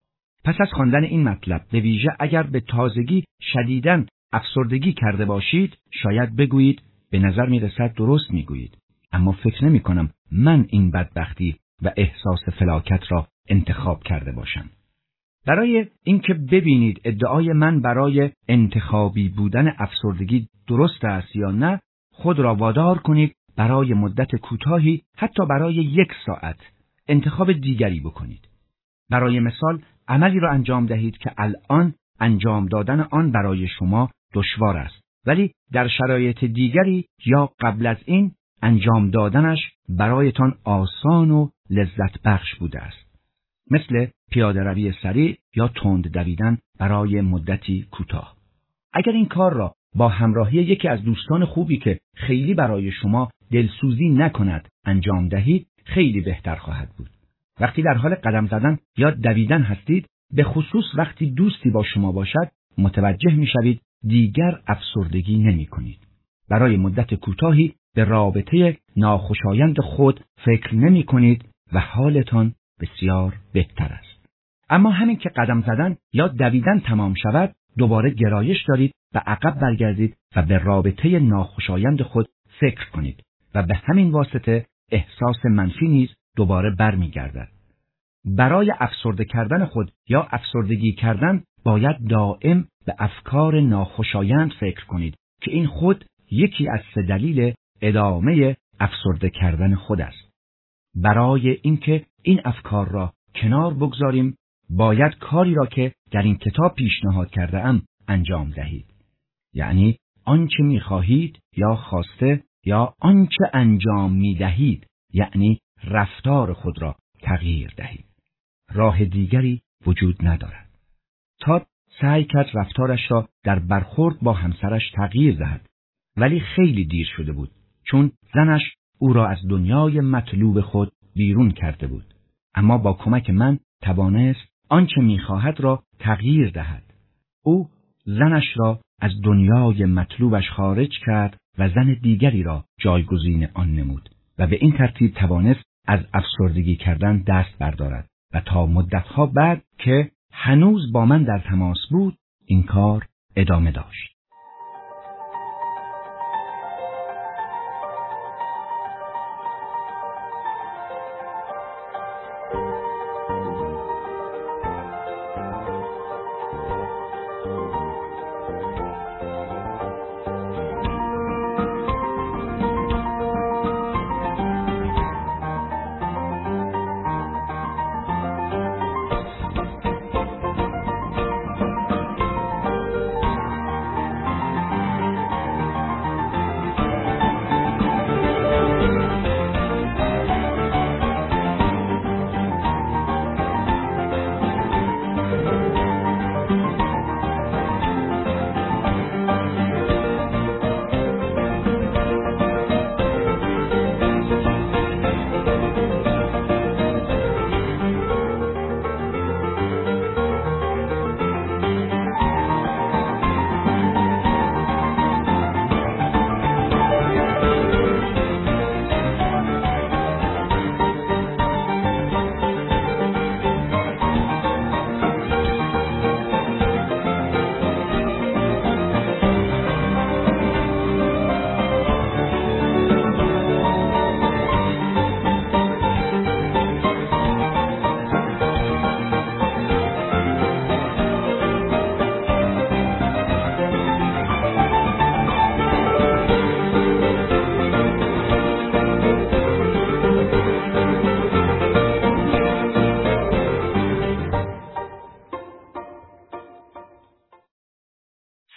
پس از خواندن این مطلب، به ویژه اگر به تازگی شدیداً افسردگی کرده باشید، شاید بگویید به نظر می رسد درست می گویید، اما فکر نمی کنم من این بدبختی و احساس فلاکت را انتخاب کرده باشم. برای اینکه ببینید ادعای من برای انتخابی بودن افسردگی درست است یا نه، خود را وادار کنید برای مدت کوتاهی، حتی برای یک ساعت، انتخاب دیگری بکنید. برای مثال، عملی را انجام دهید که الان انجام دادن آن برای شما دشوار است، ولی در شرایط دیگری یا قبل از این انجام دادنش برایتان آسان و لذت بخش بوده است. مثل پیاده روی سریع یا تند دویدن برای مدتی کوتاه. اگر این کار را با همراهی یکی از دوستان خوبی که خیلی برای شما دلسوزی نکند انجام دهید، خیلی بهتر خواهد بود. وقتی در حال قدم زدن یا دویدن هستید، به خصوص وقتی دوستی با شما باشد، متوجه می‌شوید دیگر افسردگی نمی‌کنید. برای مدت کوتاهی به رابطه ناخوشایند خود فکر نمی‌کنید و حالتان بسیار بهتر است. اما همین که قدم زدن یا دویدن تمام شود، دوباره گرایش دارید و عقب برگردید و به رابطه ناخوشایند خود فکر کنید و به همین واسطه احساس منفی نیز دوباره برمیگردد. برای افسرده کردن خود یا افسردگی کردن باید دائم به افکار ناخوشایند فکر کنید که این خود یکی از سه دلیل ادامه افسرده کردن خود است. برای اینکه این افکار را کنار بگذاریم، باید کاری را که در این کتاب پیشنهاد کرده ام انجام دهید. یعنی آنچه می‌خواهید یا خواسته یا آنچه انجام می‌دهید، یعنی رفتار خود را تغییر دهید. راه دیگری وجود ندارد. تاد سعی کرد رفتارش را در برخورد با همسرش تغییر دهد، ولی خیلی دیر شده بود، چون زنش او را از دنیای مطلوب خود بیرون کرده بود. اما با کمک من توانست آنچه می‌خواهد را تغییر دهد. او زنش را از دنیای مطلوبش خارج کرد و زن دیگری را جایگزین آن نمود و به این ترتیب توانست از افسردگی کردن دست بردارد و تا مدتها بعد که هنوز با من در تماس بود این کار ادامه داشت.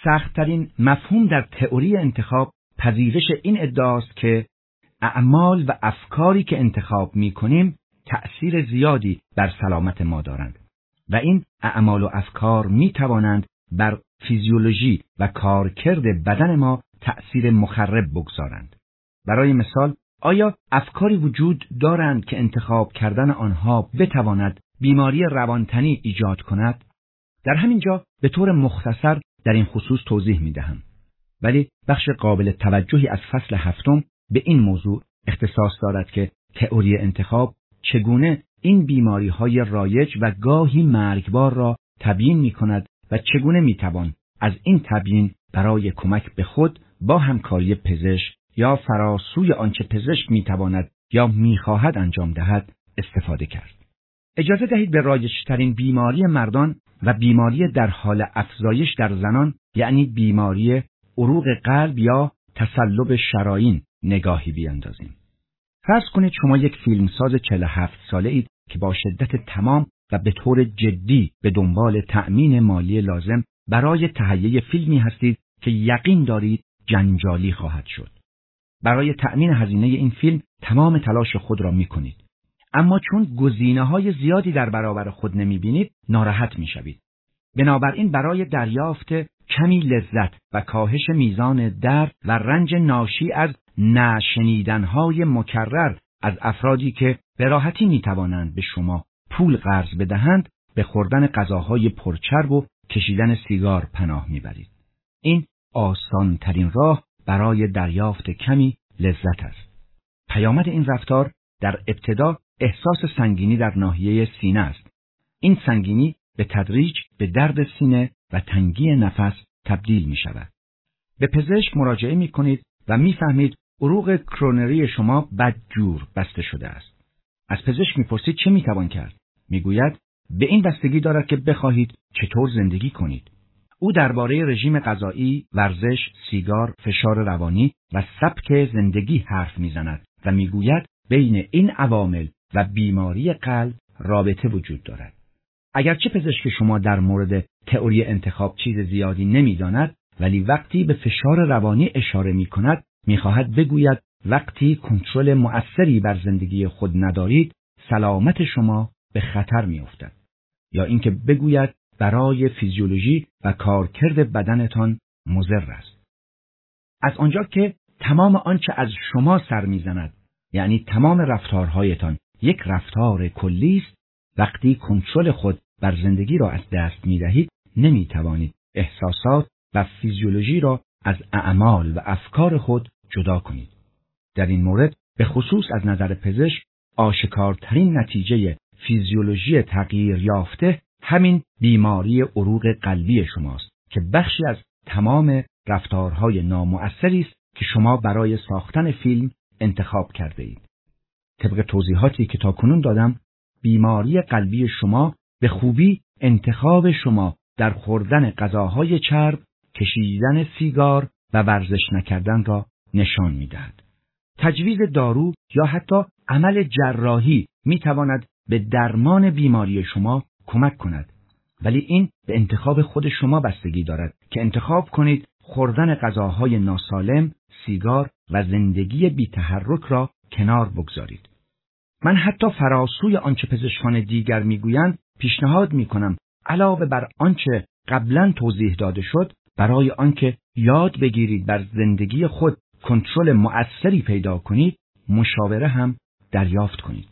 سخت‌ترین مفهوم در تئوری انتخاب پذیرش این ادعاست که اعمال و افکاری که انتخاب می‌کنیم تأثیر زیادی بر سلامت ما دارند و این اعمال و افکار می‌توانند بر فیزیولوژی و کارکرد بدن ما تأثیر مخرب بگذارند. برای مثال، آیا افکاری وجود دارند که انتخاب کردن آنها بتواند بیماری روانتنی ایجاد کند؟ در همین جا به طور مختصر در این خصوص توضیح می‌دهم. ولی بخش قابل توجهی از فصل هفتم به این موضوع اختصاص دارد که تئوری انتخاب چگونه این بیماری‌های رایج و گاهی مرگبار را تبیین می‌کند و چگونه می‌توان از این تبیین برای کمک به خود با همکاری پزشک یا فراسوی آنچه پزشک می‌تواند یا می‌خواهد انجام دهد استفاده کرد. اجازه دهید به رایج‌ترین بیماری مردان و بیماری در حال افزایش در زنان، یعنی بیماری عروق قلب یا تصلب شرايین، نگاهی بیاندازیم. فرض کنید شما یک فیلمساز چهل و هفت ساله اید که با شدت تمام و به طور جدی به دنبال تأمین مالی لازم برای تهیه فیلمی هستید که یقین دارید جنجالی خواهد شد. برای تأمین هزینه این فیلم تمام تلاش خود را می کنید. اما چون گزینه‌های زیادی در برابر خود نمی‌بینید، ناراحت می‌شوید. بنابراین برای دریافت کمی لذت و کاهش میزان درد و رنج ناشی از نشنیدن‌های مکرر از افرادی که به راحتی می‌توانند به شما پول قرض بدهند، به خوردن غذاهای پرچرب و کشیدن سیگار پناه می‌برید. این آسان‌ترین راه برای دریافت کمی لذت است. پیامد این رفتار در ابتدا احساس سنگینی در ناحیه سینه است. این سنگینی به تدریج به درد سینه و تنگی نفس تبدیل می شود. به پزشک مراجعه می کنید و می فهمید عروق کرونری شما بدجور بسته شده است. از پزشک می پرسید چه می توان کرد؟ می گوید به این بستگی دارد که بخواهید چطور زندگی کنید. او درباره رژیم غذایی، ورزش، سیگار، فشار روانی و سبک زندگی حرف می زند و می گوید بین این عوامل و بیماری قلب رابطه وجود دارد. اگرچه پزشک شما در مورد تئوری انتخاب چیز زیادی نمی‌داند، ولی وقتی به فشار روانی اشاره می‌کند، می‌خواهد بگوید وقتی کنترل مؤثری بر زندگی خود ندارید، سلامت شما به خطر می‌افتد. یا اینکه بگوید برای فیزیولوژی و کارکرد بدنتان مضر است. از آنجا که تمام آنچه از شما سر می‌زند، یعنی تمام رفتارهایتان یک رفتار کلی است، وقتی کنترل خود بر زندگی را از دست می دهید، نمی توانید احساسات و فیزیولوژی را از اعمال و افکار خود جدا کنید. در این مورد به خصوص از نظر پزشک آشکارترین نتیجه فیزیولوژی تغییر یافته همین بیماری عروق قلبی شماست که بخشی از تمام رفتارهای نامؤثری است که شما برای ساختن فیلم انتخاب کرده اید. طبق توضیحاتی که تاکنون دادم، بیماری قلبی شما به خوبی انتخاب شما در خوردن غذاهای چرب، کشیدن سیگار و ورزش نکردن را نشان می‌دهد. تجویز دارو یا حتی عمل جراحی می‌تواند به درمان بیماری شما کمک کند، ولی این به انتخاب خود شما بستگی دارد که انتخاب کنید خوردن غذاهای ناسالم، سیگار و زندگی بی‌تحرک را کنار بگذارید. من حتی فراسوی آنچه پزشکان دیگر میگویند پیشنهاد میکنم علاوه بر آنچه قبلا توضیح داده شد، برای آنکه یاد بگیرید بر زندگی خود کنترل مؤثری پیدا کنید، مشاوره هم دریافت کنید.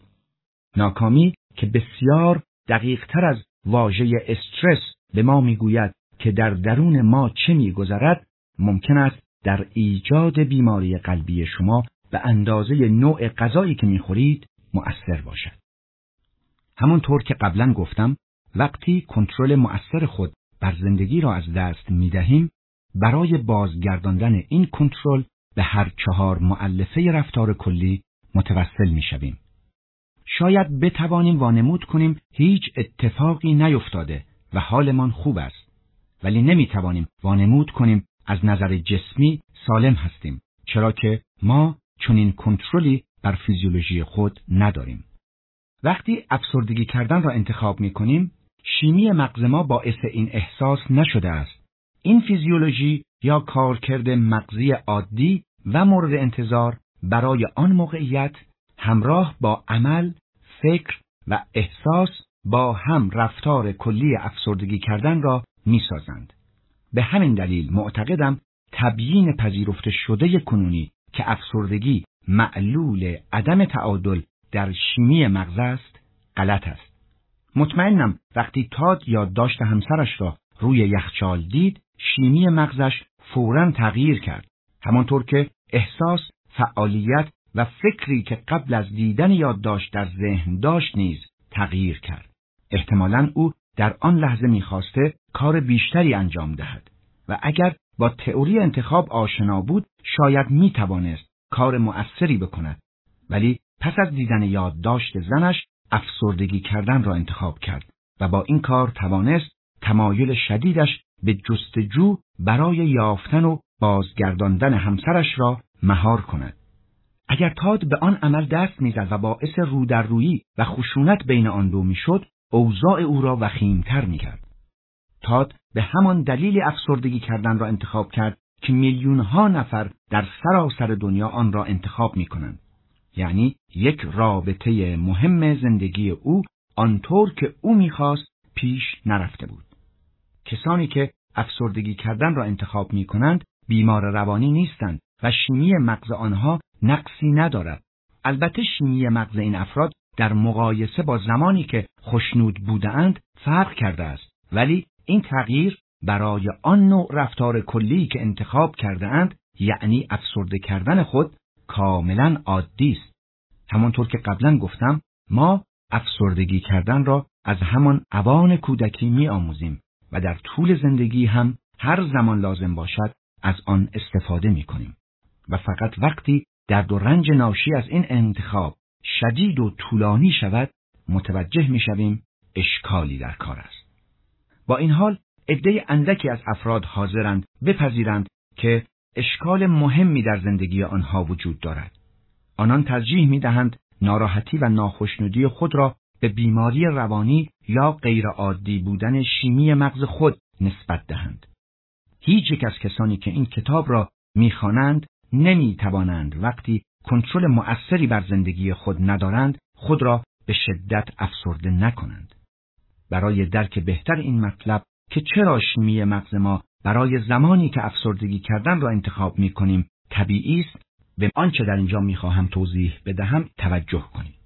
ناکامی که بسیار دقیق تر از واژه استرس به ما میگوید که در درون ما چه میگذرد، ممکن است در ایجاد بیماری قلبی شما به اندازه نوع غذایی که میخورید مؤثر باشد. همونطور که قبلا گفتم، وقتی کنترل مؤثر خود بر زندگی را از دست میدهیم، برای بازگرداندن این کنترل به هر چهار مؤلفه رفتار کلی متوسل میشویم. شاید بتوانیم وانمود کنیم هیچ اتفاقی نیفتاده و حالمان خوب است، ولی نمیتوانیم وانمود کنیم از نظر جسمی سالم هستیم، چرا که ما چنین کنترلی بر فیزیولوژی خود نداریم. وقتی افسردگی کردن را انتخاب می کنیم، شیمی مغز ما باعث این احساس نشده است. این فیزیولوژی یا کارکرد مغزی عادی و مورد انتظار برای آن موقعیت همراه با عمل، فکر و احساس با هم رفتار کلی افسردگی کردن را می‌سازند. به همین دلیل معتقدم تبیین پذیرفته شده کنونی که افسردگی معلول عدم تعادل در شیمی مغز است، غلط است. مطمئنم وقتی تاد یادداشت همسرش را روی یخچال دید، شیمی مغزش فوراً تغییر کرد، همانطور که احساس، فعالیت و فکری که قبل از دیدن یادداشت در ذهن داشت نیز تغییر کرد. احتمالاً او در آن لحظه می‌خواسته کار بیشتری انجام دهد و اگر با تئوری انتخاب آشنا بود شاید می‌توانست کار مؤثری بکند، ولی پس از دیدن یادداشت زنش افسردگی کردن را انتخاب کرد و با این کار توانست تمایل شدیدش به جستجو برای یافتن و بازگرداندن همسرش را مهار کند. اگر تاد به آن عمل دست می‌زد و باعث رودررویی و خشونت بین آن دو می‌شد، اوضاع او را وخیم‌تر می‌کرد. تاد به همان دلیل افسردگی کردن را انتخاب کرد که میلیون‌ها نفر در سراسر دنیا آن را انتخاب می‌کنند. یعنی یک رابطه مهم زندگی او آنطور که او می‌خواست پیش نرفته بود. کسانی که افسردگی کردن را انتخاب می‌کنند بیمار روانی نیستند و شیمی مغز آنها نقصی ندارد. البته شیمی مغز این افراد در مقایسه با زمانی که خوشنود بودند فرق کرده است، ولی این تغییر برای آن نوع رفتار کلی که انتخاب کرده اند، یعنی افسرده کردن خود، کاملا عادی است. همانطور که قبلا گفتم، ما افسردگی کردن را از همان اوان کودکی می آموزیم و در طول زندگی هم هر زمان لازم باشد از آن استفاده می کنیم و فقط وقتی درد و رنج ناشی از این انتخاب شدید و طولانی شود متوجه می شویم اشکالی در کار است. با این حال عده اندکی از افراد حاضرند بپذیرند که اشکال مهمی در زندگی آنها وجود دارد. آنان ترجیح می دهند ناراحتی و ناخشنودی خود را به بیماری روانی یا غیر عادی بودن شیمی مغز خود نسبت دهند. هیچ یک از کسانی که این کتاب را می خوانند نمی توانند وقتی کنترل مؤثری بر زندگی خود ندارند خود را به شدت افسرده نکنند. برای درک بهتر این مطلب که چرا شیمی مغز ما برای زمانی که افسردگی کردن را انتخاب می کنیم طبیعی است، به آنچه در اینجا می خواهم توضیح بدهم توجه کنید.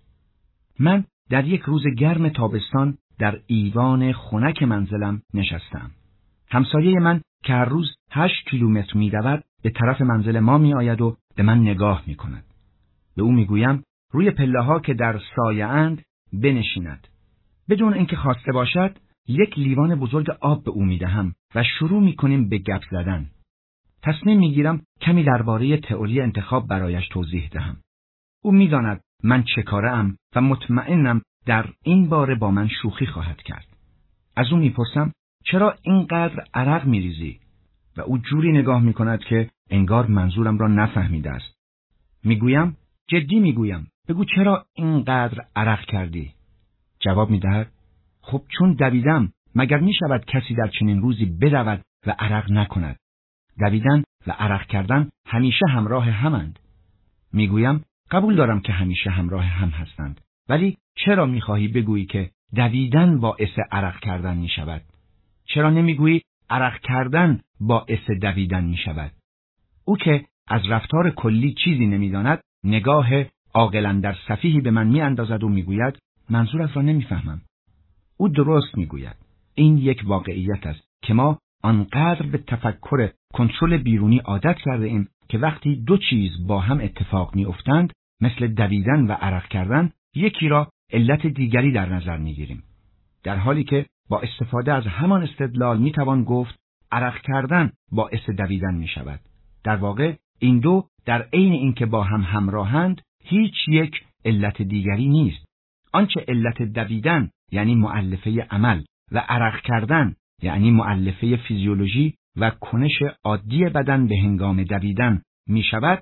من در یک روز گرم تابستان در ایوان خنک منزلم نشستم. همسایه من که هر روز هشت کیلومتر می دود به طرف منزل ما می آید و به من نگاه می کند. به او می گویم روی پله ها که در سایه اند بنشیند. بدون اینکه خواسته باشد یک لیوان بزرگ آب به او می دهم و شروع می کنیم به گپ زدن. تصمیم می گیرم کمی درباره تئوری انتخاب برایش توضیح دهم. او می داند من چه کاره ام و مطمئنم در این باره با من شوخی خواهد کرد. از او می پرسم چرا اینقدر عرق می ریزی؟ و او جوری نگاه می کند که انگار منظورم را نفهمیده است. می گویم جدی می گویم بگو چرا اینقدر عرق کردی؟ جواب می دهد خب چون دویدم، مگر می شود کسی در چنین روزی بدود و عرق نکند؟ دویدن و عرق کردن همیشه همراه همند. می گویم قبول دارم که همیشه همراه هم هستند، ولی چرا می خواهی بگویی که دویدن باعث عرق کردن می شود؟ چرا نمی گویی عرق کردن باعث دویدن می شود؟ او که از رفتار کلی چیزی نمی داند، نگاه عاقلاً در سفیهی به من می اندازد و می گوید منظورت را نمی فهمم. او درست می گوید. این یک واقعیت است که ما آنقدر به تفکر کنترل بیرونی عادت کرده ایم که وقتی دو چیز با هم اتفاق می افتند، مثل دویدن و عرق کردن، یکی را علت دیگری در نظر می گیریم. در حالی که با استفاده از همان استدلال می توان گفت عرق کردن باعث دویدن می شود. در واقع این دو در عین اینکه با هم همراهند، هیچ یک علت دیگری نیست. آنچه علت دویدن یعنی مؤلفه عمل و عرق کردن یعنی مؤلفه فیزیولوژی و کنش عادی بدن به هنگام دویدن می شود،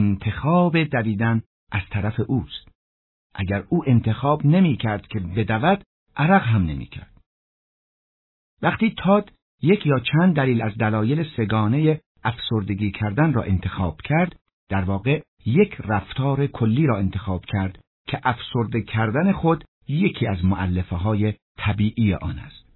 انتخاب دویدن از طرف اوست. اگر او انتخاب نمی کرد که بدود، عرق هم نمی کرد. وقتی تاد یک یا چند دلیل از دلایل سگانه افسردگی کردن را انتخاب کرد، در واقع یک رفتار کلی را انتخاب کرد که افسرده کردن خود یکی از مؤلفه‌های طبیعی آن است.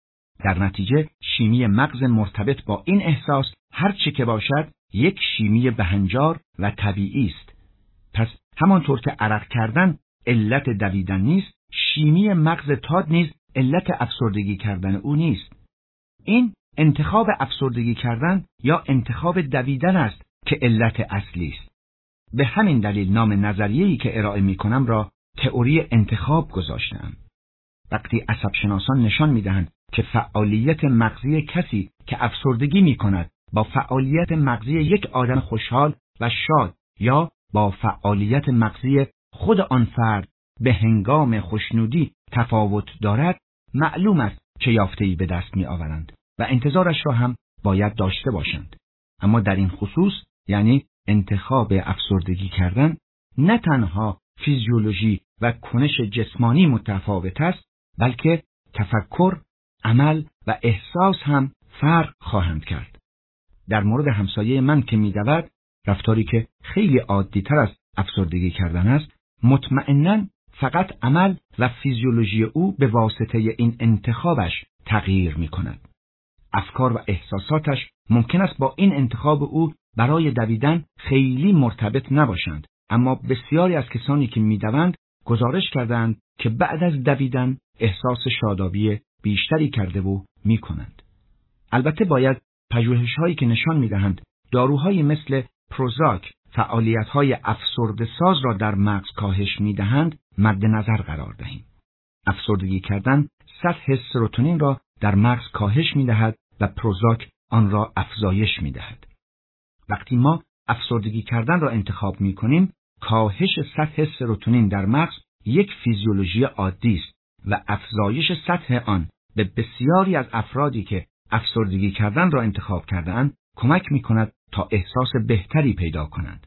در نتیجه شیمی مغز مرتبط با این احساس هر چه که باشد یک شیمی بهنجار و طبیعی است. پس همانطور که عرق کردن علت دویدن نیست، شیمی مغز تاد نیز علت افسردگی کردن او نیست. این انتخاب افسردگی کردن یا انتخاب دویدن است که علت اصلی است. به همین دلیل نام نظریه‌ای که ارائه می‌کنم را تئوری انتخاب گذاشتم. وقتی عصبشناسان نشان می‌دهند که فعالیت مغزی کسی که افسردگی می‌کند با فعالیت مغزی یک آدم خوشحال و شاد یا با فعالیت مغزی خود آن فرد به هنگام خوشنودی تفاوت دارد، معلوم است چه یافته‌ای به دست می‌آورند و انتظارش را هم باید داشته باشند. اما در این خصوص، یعنی انتخاب افسردگی کردن، نه تنها فیزیولوژی و کنش جسمانی متفاوت است، بلکه تفکر، عمل و احساس هم فرق خواهند کرد. در مورد همسایه من که می‌دود، رفتاری که خیلی عادی‌تر از افسردگی کردن است، مطمئناً فقط عمل و فیزیولوژی او به واسطه این انتخابش تغییر می‌کند. افکار و احساساتش ممکن است با این انتخاب او برای دویدن خیلی مرتبط نباشند، اما بسیاری از کسانی که می‌دوند گزارش کردند که بعد از دویدن احساس شادابی بیشتری کرده و می‌کنند. البته باید پژوهش‌هایی که نشان می‌دهند داروهایی مثل پروزاک فعالیت‌های افسرده ساز را در مغز کاهش می‌دهند مد نظر قرار دهیم. افسردگی کردن سطح سروتونین را در مغز کاهش می‌دهد و پروزاک آن را افزایش می‌دهد. وقتی ما افسردگی کردن را انتخاب می‌کنیم، کاهش سطح سروتونین در مغز یک فیزیولوژی عادی است و افزایش سطح آن به بسیاری از افرادی که افسردگی کردن را انتخاب کرده‌اند کمک می‌کند تا احساس بهتری پیدا کنند.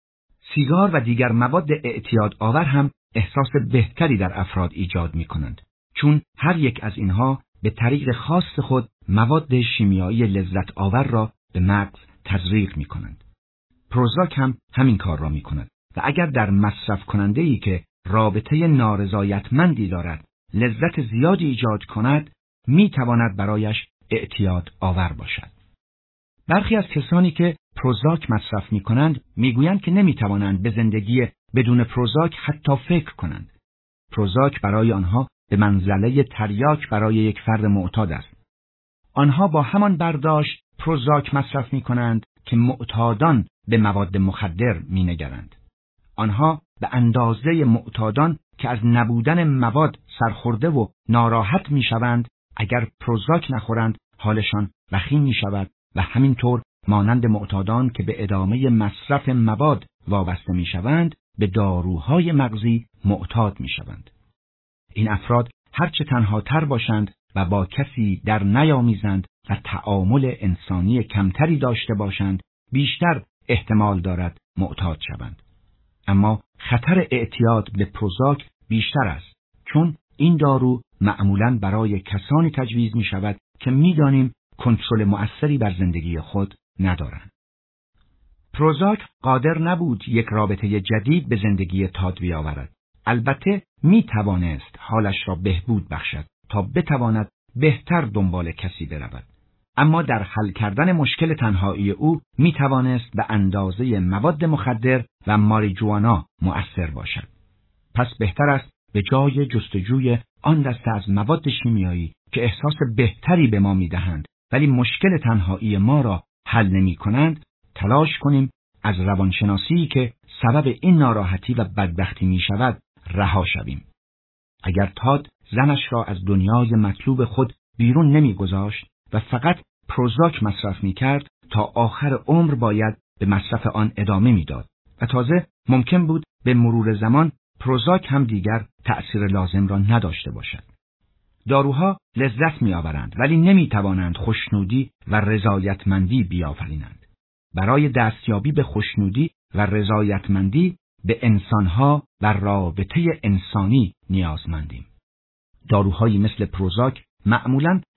سیگار و دیگر مواد اعتیاد آور هم احساس بهتری در افراد ایجاد می‌کنند، چون هر یک از اینها به طریق خاص خود مواد شیمیایی لذت آور را به مغز تزریق می‌کنند. پروزاک هم همین کار را می‌کند و اگر در مصرف کننده‌ای که رابطه نارضایتمندی دارد لذت زیادی ایجاد کند، می‌تواند برایش اعتیاد آور باشد. برخی از کسانی که پروزاک مصرف می‌کنند می‌گویند که نمی‌توانند به زندگی بدون پروزاک حتی فکر کنند. پروزاک برای آنها به منزله تریاک برای یک فرد معتاد است. آنها با همان برداشت پروزاک مصرف می‌کنند که معتادان به مواد مخدر می‌نگرند. آنها به اندازه معتادان که از نبودن مواد سرخورده و ناراحت می‌شوند، اگر پروزاک نخورند حالشان وخیم می‌شود و همینطور مانند معتادان که به ادامه مصرف مواد وابسته می‌شوند، به داروهای مغزی معتاد می‌شوند. این افراد هرچه تنها تر باشند و با کسی در نیامیزند و تعامل انسانی کمتری داشته باشند، بیشتر احتمال دارد معتاد شوند. اما خطر اعتیاد به پروزاک بیشتر است، چون این دارو معمولاً برای کسانی تجویز می شود که می دانیم کنترل مؤثری بر زندگی خود ندارند. پروزاک قادر نبود یک رابطه جدید به زندگی تاد بیاورد. البته می توانست حالش را بهبود بخشد تا بتواند بهتر دنبال کسی برود. اما در حل کردن مشکل تنهایی او می توانست به اندازه مواد مخدر و ماریجوانا مؤثر باشد. پس بهتر است به جای جستجوی آن دسته از مواد شیمیایی که احساس بهتری به ما می دهند ولی مشکل تنهایی ما را حل نمی کنند، تلاش کنیم از روانشناسی که سبب این ناراحتی و بدبختی می شود رها شویم. اگر تاد زنش را از دنیای مطلوب خود بیرون نمی گذاشت و فقط پروزاک مصرف می کرد، تا آخر عمر باید به مصرف آن ادامه می داد و تازه ممکن بود به مرور زمان پروزاک هم دیگر تأثیر لازم را نداشته باشد. داروها لذت می آورند ولی نمی توانند خوشنودی و رضایتمندی بیافرینند. برای دستیابی به خوشنودی و رضایتمندی به انسانها و رابطه انسانی نیازمندیم. داروهایی مثل پروزاک معمولاً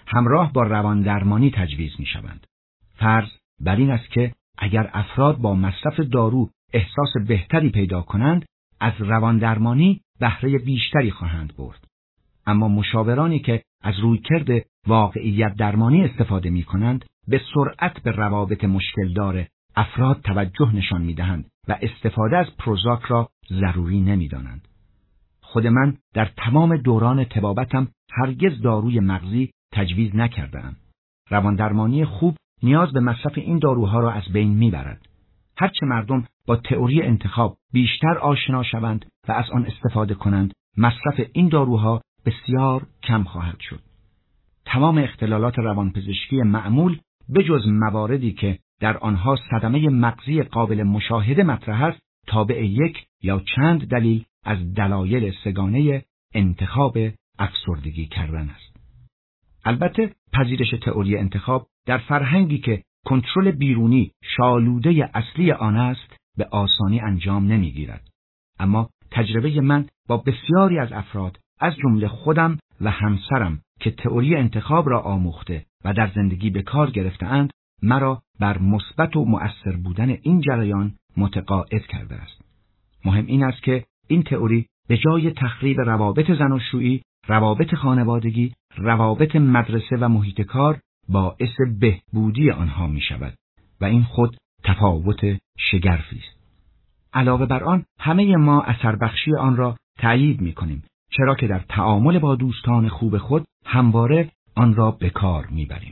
همراه با روان درمانی تجویز می شوند. فرض بر این است که اگر افراد با مصرف دارو احساس بهتری پیدا کنند، از روان درمانی بهره بیشتری خواهند برد. اما مشاورانی که از رویکرد واقعیت درمانی استفاده می کنند، به سرعت به روابط مشکلدار افراد توجه نشان می دهند و استفاده از پروزاک را ضروری نمی دانند. خود من در تمام دوران طبابتم هرگز داروی مغزی تجویز نکردم. روان درمانی خوب نیاز به مصرف این داروها را از بین می برد. هرچه مردم با تئوری انتخاب بیشتر آشنا شوند و از آن استفاده کنند، مصرف این داروها بسیار کم خواهد شد. تمام اختلالات روانپزشکی معمول بجز مواردی که در آنها صدمه مغزی قابل مشاهده مطرح است، تابع یک یا چند دلیل از دلایل سگانه انتخاب افسردگی کردن است. البته پذیرش تئوری انتخاب در فرهنگی که کنترل بیرونی شالوده اصلی آن است به آسانی انجام نمیگیرد. اما تجربه من با بسیاری از افراد از جمله خودم و همسرم که تئوری انتخاب را آموخته و در زندگی به کار گرفته‌اند، مرا بر مثبت و مؤثر بودن این جریان متقاعد کرده است. مهم این است که این تئوری به جای تخریب روابط زناشویی، روابط خانوادگی، روابط مدرسه و محیط کار باعث بهبودی آنها می شود و این خود تفاوت شگرفی است. علاوه بر آن همه ما اثر بخشی آن را تأیید می کنیم، چرا که در تعامل با دوستان خوب خود همواره آن را به کار می بریم.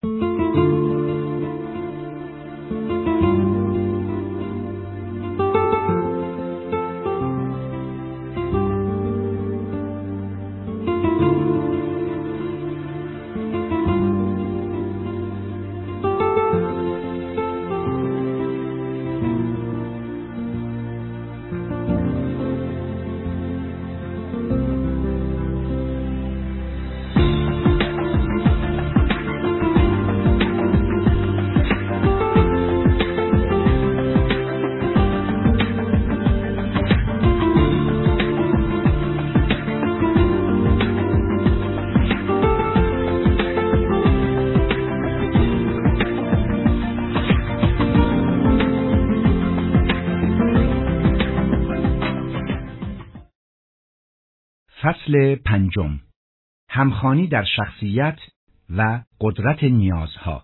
فصل پنجم، همخوانی در شخصیت و قدرت نیازها.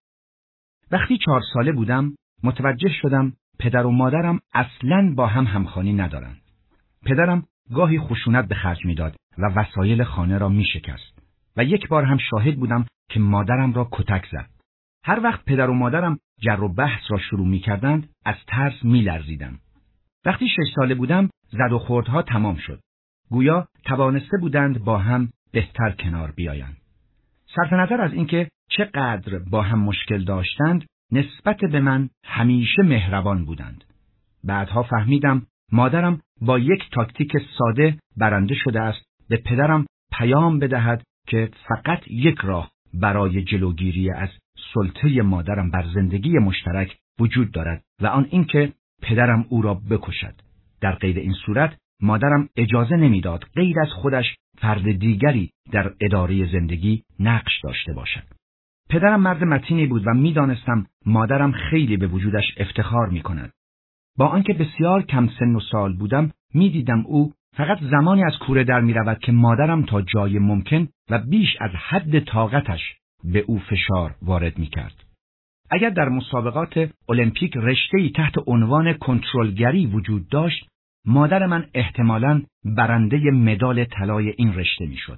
وقتی چهار ساله بودم متوجه شدم پدر و مادرم اصلاً با هم همخوانی ندارند. پدرم گاهی خشونت به خرج میداد و وسایل خانه را می شکست و یک بار هم شاهد بودم که مادرم را کتک زد. هر وقت پدر و مادرم جر و بحث را شروع می کردند از ترس می لرزیدم. وقتی شش ساله بودم زد و خوردها تمام شد. گویا توانسته بودند با هم بهتر کنار بیایند. صرف نظر از اینکه چقدر با هم مشکل داشتند، نسبت به من همیشه مهربان بودند. بعدها فهمیدم مادرم با یک تاکتیک ساده برنده شده است به پدرم پیام بدهد که فقط یک راه برای جلوگیری از سلطه مادرم بر زندگی مشترک وجود دارد و آن اینکه پدرم او را بکشد. در غیر این صورت مادرم اجازه نمیداد غیر از خودش فرد دیگری در اداره زندگی نقش داشته باشد. پدرم مرد متینی بود و میدانستم مادرم خیلی به وجودش افتخار میکند. با آنکه بسیار کم سن و سال بودم، میدیدم او فقط زمانی از کوره در میرود که مادرم تا جای ممکن و بیش از حد طاقتش به او فشار وارد میکرد. اگر در مسابقات المپیک رشته‌ای تحت عنوان کنترلگری وجود داشت، مادر من احتمالاً برنده مدال طلای این رشته میشد.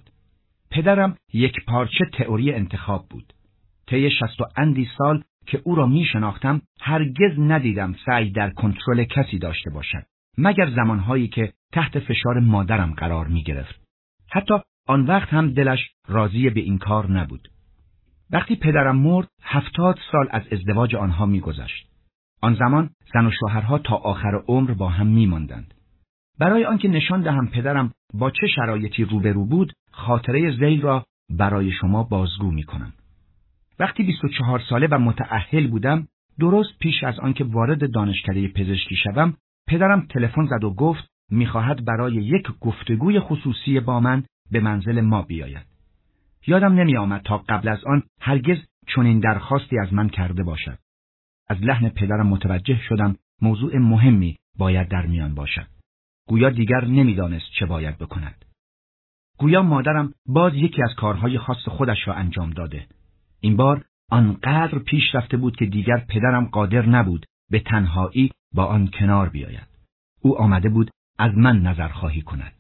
پدرم یک پارچه تئوری انتخاب بود. طی شصت و اندی سال که او را می شناختم هرگز ندیدم سعی در کنترل کسی داشته باشد، مگر زمانهایی که تحت فشار مادرم قرار می گرفت. حتی آن وقت هم دلش راضی به این کار نبود. وقتی پدرم مرد، هفتاد سال از ازدواج آنها می گذشت. آن زمان زن و شوهرها تا آخر عمر با هم می ماندند. برای آنکه نشان دهم پدرم با چه شرایطی روبرو بود، خاطره ذیل را برای شما بازگو می کنم. وقتی بیست و چهار ساله و متأهل بودم، درست پیش از آنکه وارد دانشکده پزشکی شوم، پدرم تلفن زد و گفت می‌خواهد برای یک گفتگوی خصوصی با من به منزل ما بیاید. یادم نمی آمد تا قبل از آن هرگز چنین درخواستی از من کرده باشد. از لحن پدرم متوجه شدم موضوع مهمی باید در میان باشد. گویا دیگر نمیدانست چه باید بکند. گویا مادرم باز یکی از کارهای خاص خودش را انجام داده. این بار آنقدر پیش رفته بود که دیگر پدرم قادر نبود به تنهایی با آن کنار بیاید. او آمده بود از من نظرخواهی کند.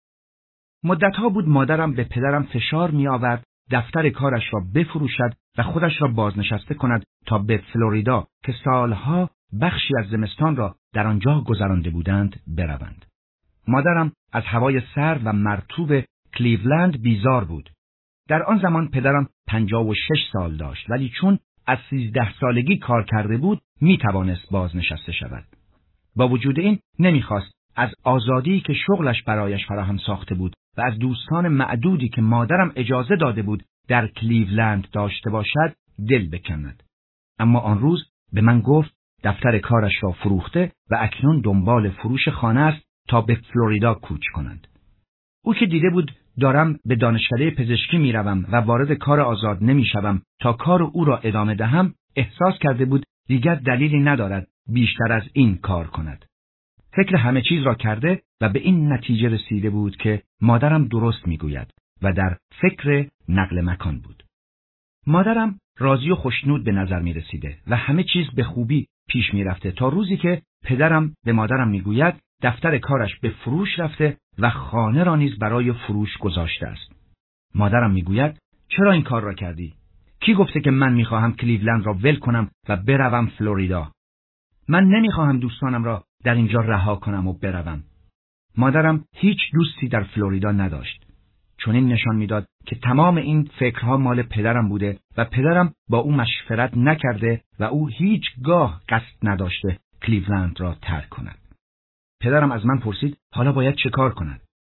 مدتها بود مادرم به پدرم فشار می آورد دفتر کارش را بفروشد و خودش را بازنشسته کند تا به فلوریدا که سالها بخشی از زمستان را در آنجا گذرانده بودند بروند. مادرم از هوای سرد و مرطوب کلیولند بیزار بود. در آن زمان پدرم پنجاه و شش سال داشت، ولی چون از سیزده سالگی کار کرده بود می توانست بازنشسته شود. با وجود این نمیخواست از آزادی که شغلش برایش فراهم ساخته بود و از دوستان معدودی که مادرم اجازه داده بود در کلیولند داشته باشد دل بکند. اما آن روز به من گفت دفتر کارش را فروخته و اکنون دنبال فروش خانه است تا به فلوریدا کوچ کنند. او که دیده بود دارم به دانشکده پزشکی می روم و وارد کار آزاد نمی شوم تا کار او را ادامه دهم، احساس کرده بود دیگر دلیلی ندارد بیشتر از این کار کند. فکر همه چیز را کرده و به این نتیجه رسیده بود که مادرم درست می گوید و در فکر نقل مکان بود. مادرم راضی و خوشنود به نظر می رسیده و همه چیز به خوبی پیش می رفته تا روزی که پدرم به مادرم می گوید دفتر کارش به فروش رفته و خانه را نیز برای فروش گذاشته است. مادرم می گوید چرا این کار را کردی؟ کی گفته که من می خواهم کلیولند را ول کنم و بروم فلوریدا؟ من نمی خواهم دوستانم را در اینجا رها کنم و بروم. مادرم هیچ دوستی در فلوریدا نداشت. چون این نشان میداد که تمام این فکرها مال پدرم بوده و پدرم با او مشورت نکرده و او هیچگاه قصد نداشته کلیولند را ترک کند. پدرم از من پرسید حالا باید چه کار کند؟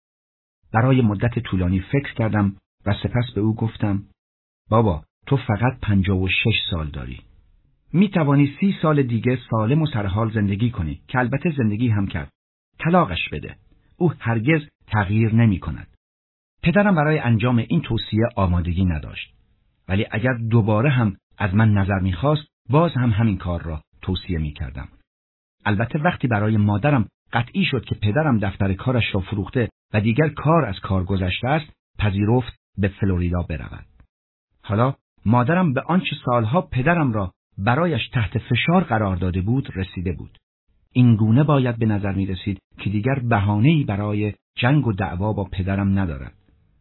برای مدت طولانی فکر کردم و سپس به او گفتم بابا تو فقط پنجاه و شش سال داری. می توانی سی سال دیگه سالم و سرحال زندگی کنی که البته زندگی هم کرد. طلاقش بده. او هرگز تغییر نمی کند. پدرم برای انجام این توصیه آمادگی نداشت. ولی اگر دوباره هم از من نظر می خواست باز هم همین کار را توصیه می کردم. البته وقتی برای مادرم قطعی شد که پدرم دفتر کارش را فروخته و دیگر کار از کار گذشته است، پذیرفت به فلوریدا برود. حالا مادرم به آنچه سالها پدرم را برایش تحت فشار قرار داده بود رسیده بود. این گونه باید به نظر می رسید که دیگر بهانه‌ای برای جنگ و دعوا با پدرم ندارد.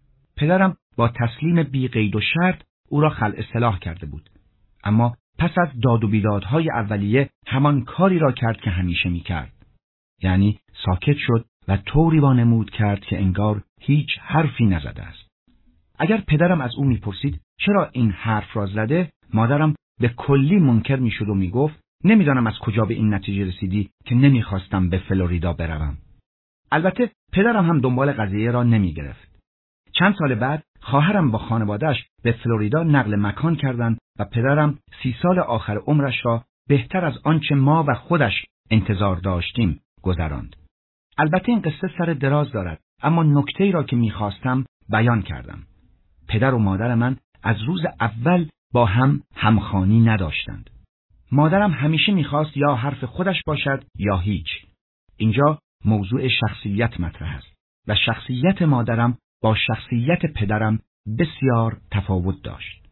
پدرم با تسلیم بی قید و شرط او را خلع اصلاح کرده بود. اما پس از داد و بیدادهای اولیه همان کاری را کرد که همیشه می کرد. یعنی ساکت شد و طوری وانمود کرد که انگار هیچ حرفی نزده است. اگر پدرم از او می پرسید چرا این حرف را زده، مادرم به کلی منکر می شد و می گفت نمیدانم از کجا به این نتیجه رسیدی که نمیخواستم به فلوریدا بروم. البته پدرم هم دنبال قضیه را نمی گرفت. چند سال بعد خواهرم با خانواده‌اش به فلوریدا نقل مکان کردند و پدرم سی سال آخر عمرش را بهتر از آنچه ما و خودش انتظار داشتیم گذراند. البته این قصه سر دراز دارد، اما نکته‌ای را که می‌خواستم بیان کردم. پدر و مادر من از روز اول با هم همخوانی نداشتند. مادرم همیشه می‌خواست یا حرف خودش باشد یا هیچ. اینجا موضوع شخصیت مطرح است و شخصیت مادرم با شخصیت پدرم بسیار تفاوت داشت.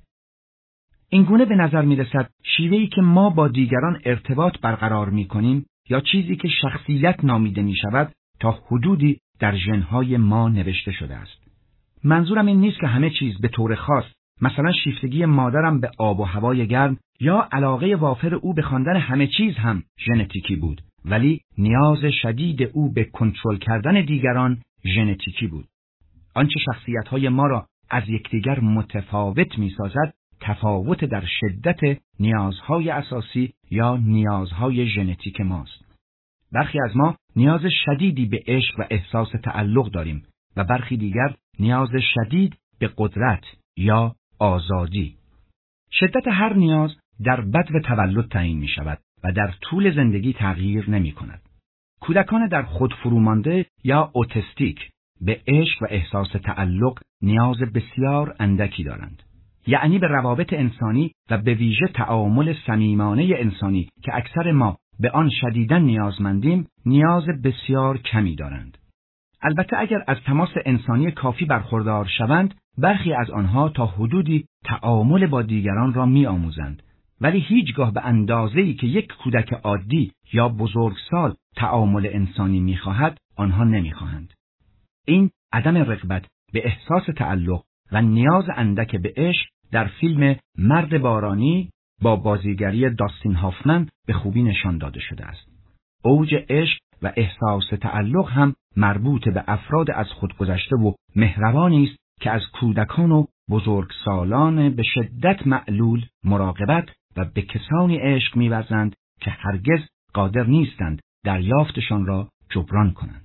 اینگونه به نظر می‌رسد شیوهی که ما با دیگران ارتباط برقرار می‌کنیم یا چیزی که شخصیت نامیده می‌شود تا حدودی در ژن‌های ما نوشته شده است. منظورم این نیست که همه چیز به طور خاص، مثلا شیفتگی مادرم به آب و هوای گرم یا علاقه وافر او به خواندن همه چیز هم ژنتیکی بود، ولی نیاز شدید او به کنترل کردن دیگران ژنتیکی بود. آنچه شخصیت‌های ما را از یکدیگر متفاوت می‌سازد، تفاوت در شدت نیازهای اساسی یا نیازهای ژنتیک ماست. برخی از ما نیاز شدیدی به عشق و احساس تعلق داریم و برخی دیگر نیاز شدید به قدرت یا آزادی. شدت هر نیاز در بدو تولد تعیین می شود و در طول زندگی تغییر نمی کند. کودکان در خود فرومانده یا اوتیستیک به عشق و احساس تعلق نیاز بسیار اندکی دارند. یعنی به روابط انسانی و به ویژه تعامل صمیمانه انسانی که اکثر ما به آن شدیداً نیازمندیم، نیاز بسیار کمی دارند. البته اگر از تماس انسانی کافی برخوردار شوند، برخی از آنها تا حدودی تعامل با دیگران را می‌آموزند، ولی هیچگاه به اندازه‌ای که یک کودک عادی یا بزرگسال تعامل انسانی می‌خواهد، آنها نمی‌خواهند. این عدم رغبت به احساس تعلق و نیاز اندک به عشق در فیلم مرد بارانی با بازیگری داستین هافمن به خوبی نشان داده شده است. اوج عشق و احساس تعلق هم مربوط به افراد از خود گذشته و مهربانی است که از کودکان و بزرگسالان به شدت معلول مراقبت و به کسانی عشق می‌ورزند که هرگز قادر نیستند دریافتشان را جبران کنند.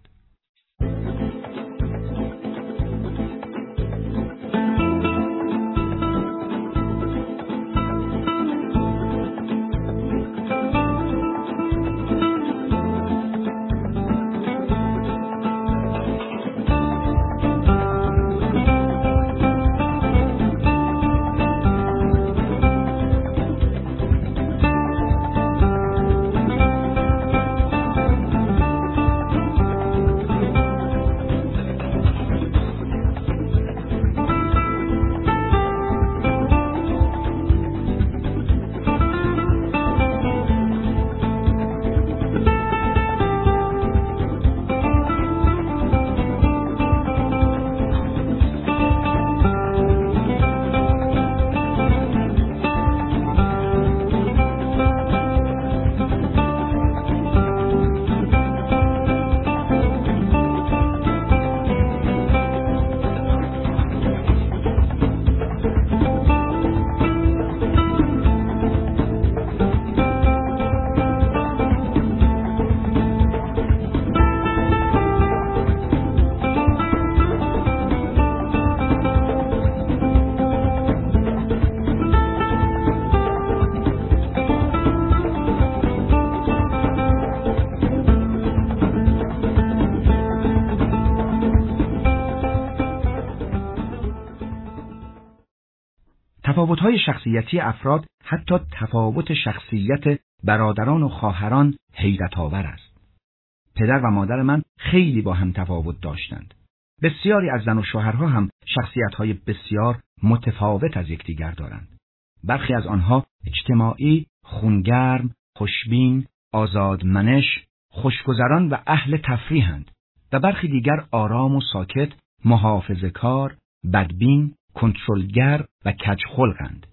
تفاوت‌های شخصیتی افراد، حتی تفاوت شخصیت برادران و خواهران، حیرت‌آور است. پدر و مادر من خیلی با هم تفاوت داشتند. بسیاری از زن و شوهرها هم شخصیت‌های بسیار متفاوت از یکدیگر دارند. برخی از آنها اجتماعی، خونگرم، خوشبین، آزادمنش، خوشگذران و اهل تفریحند و برخی دیگر آرام و ساکت، محافظه‌کار، بدبین، کنترلگر و کجخلقند.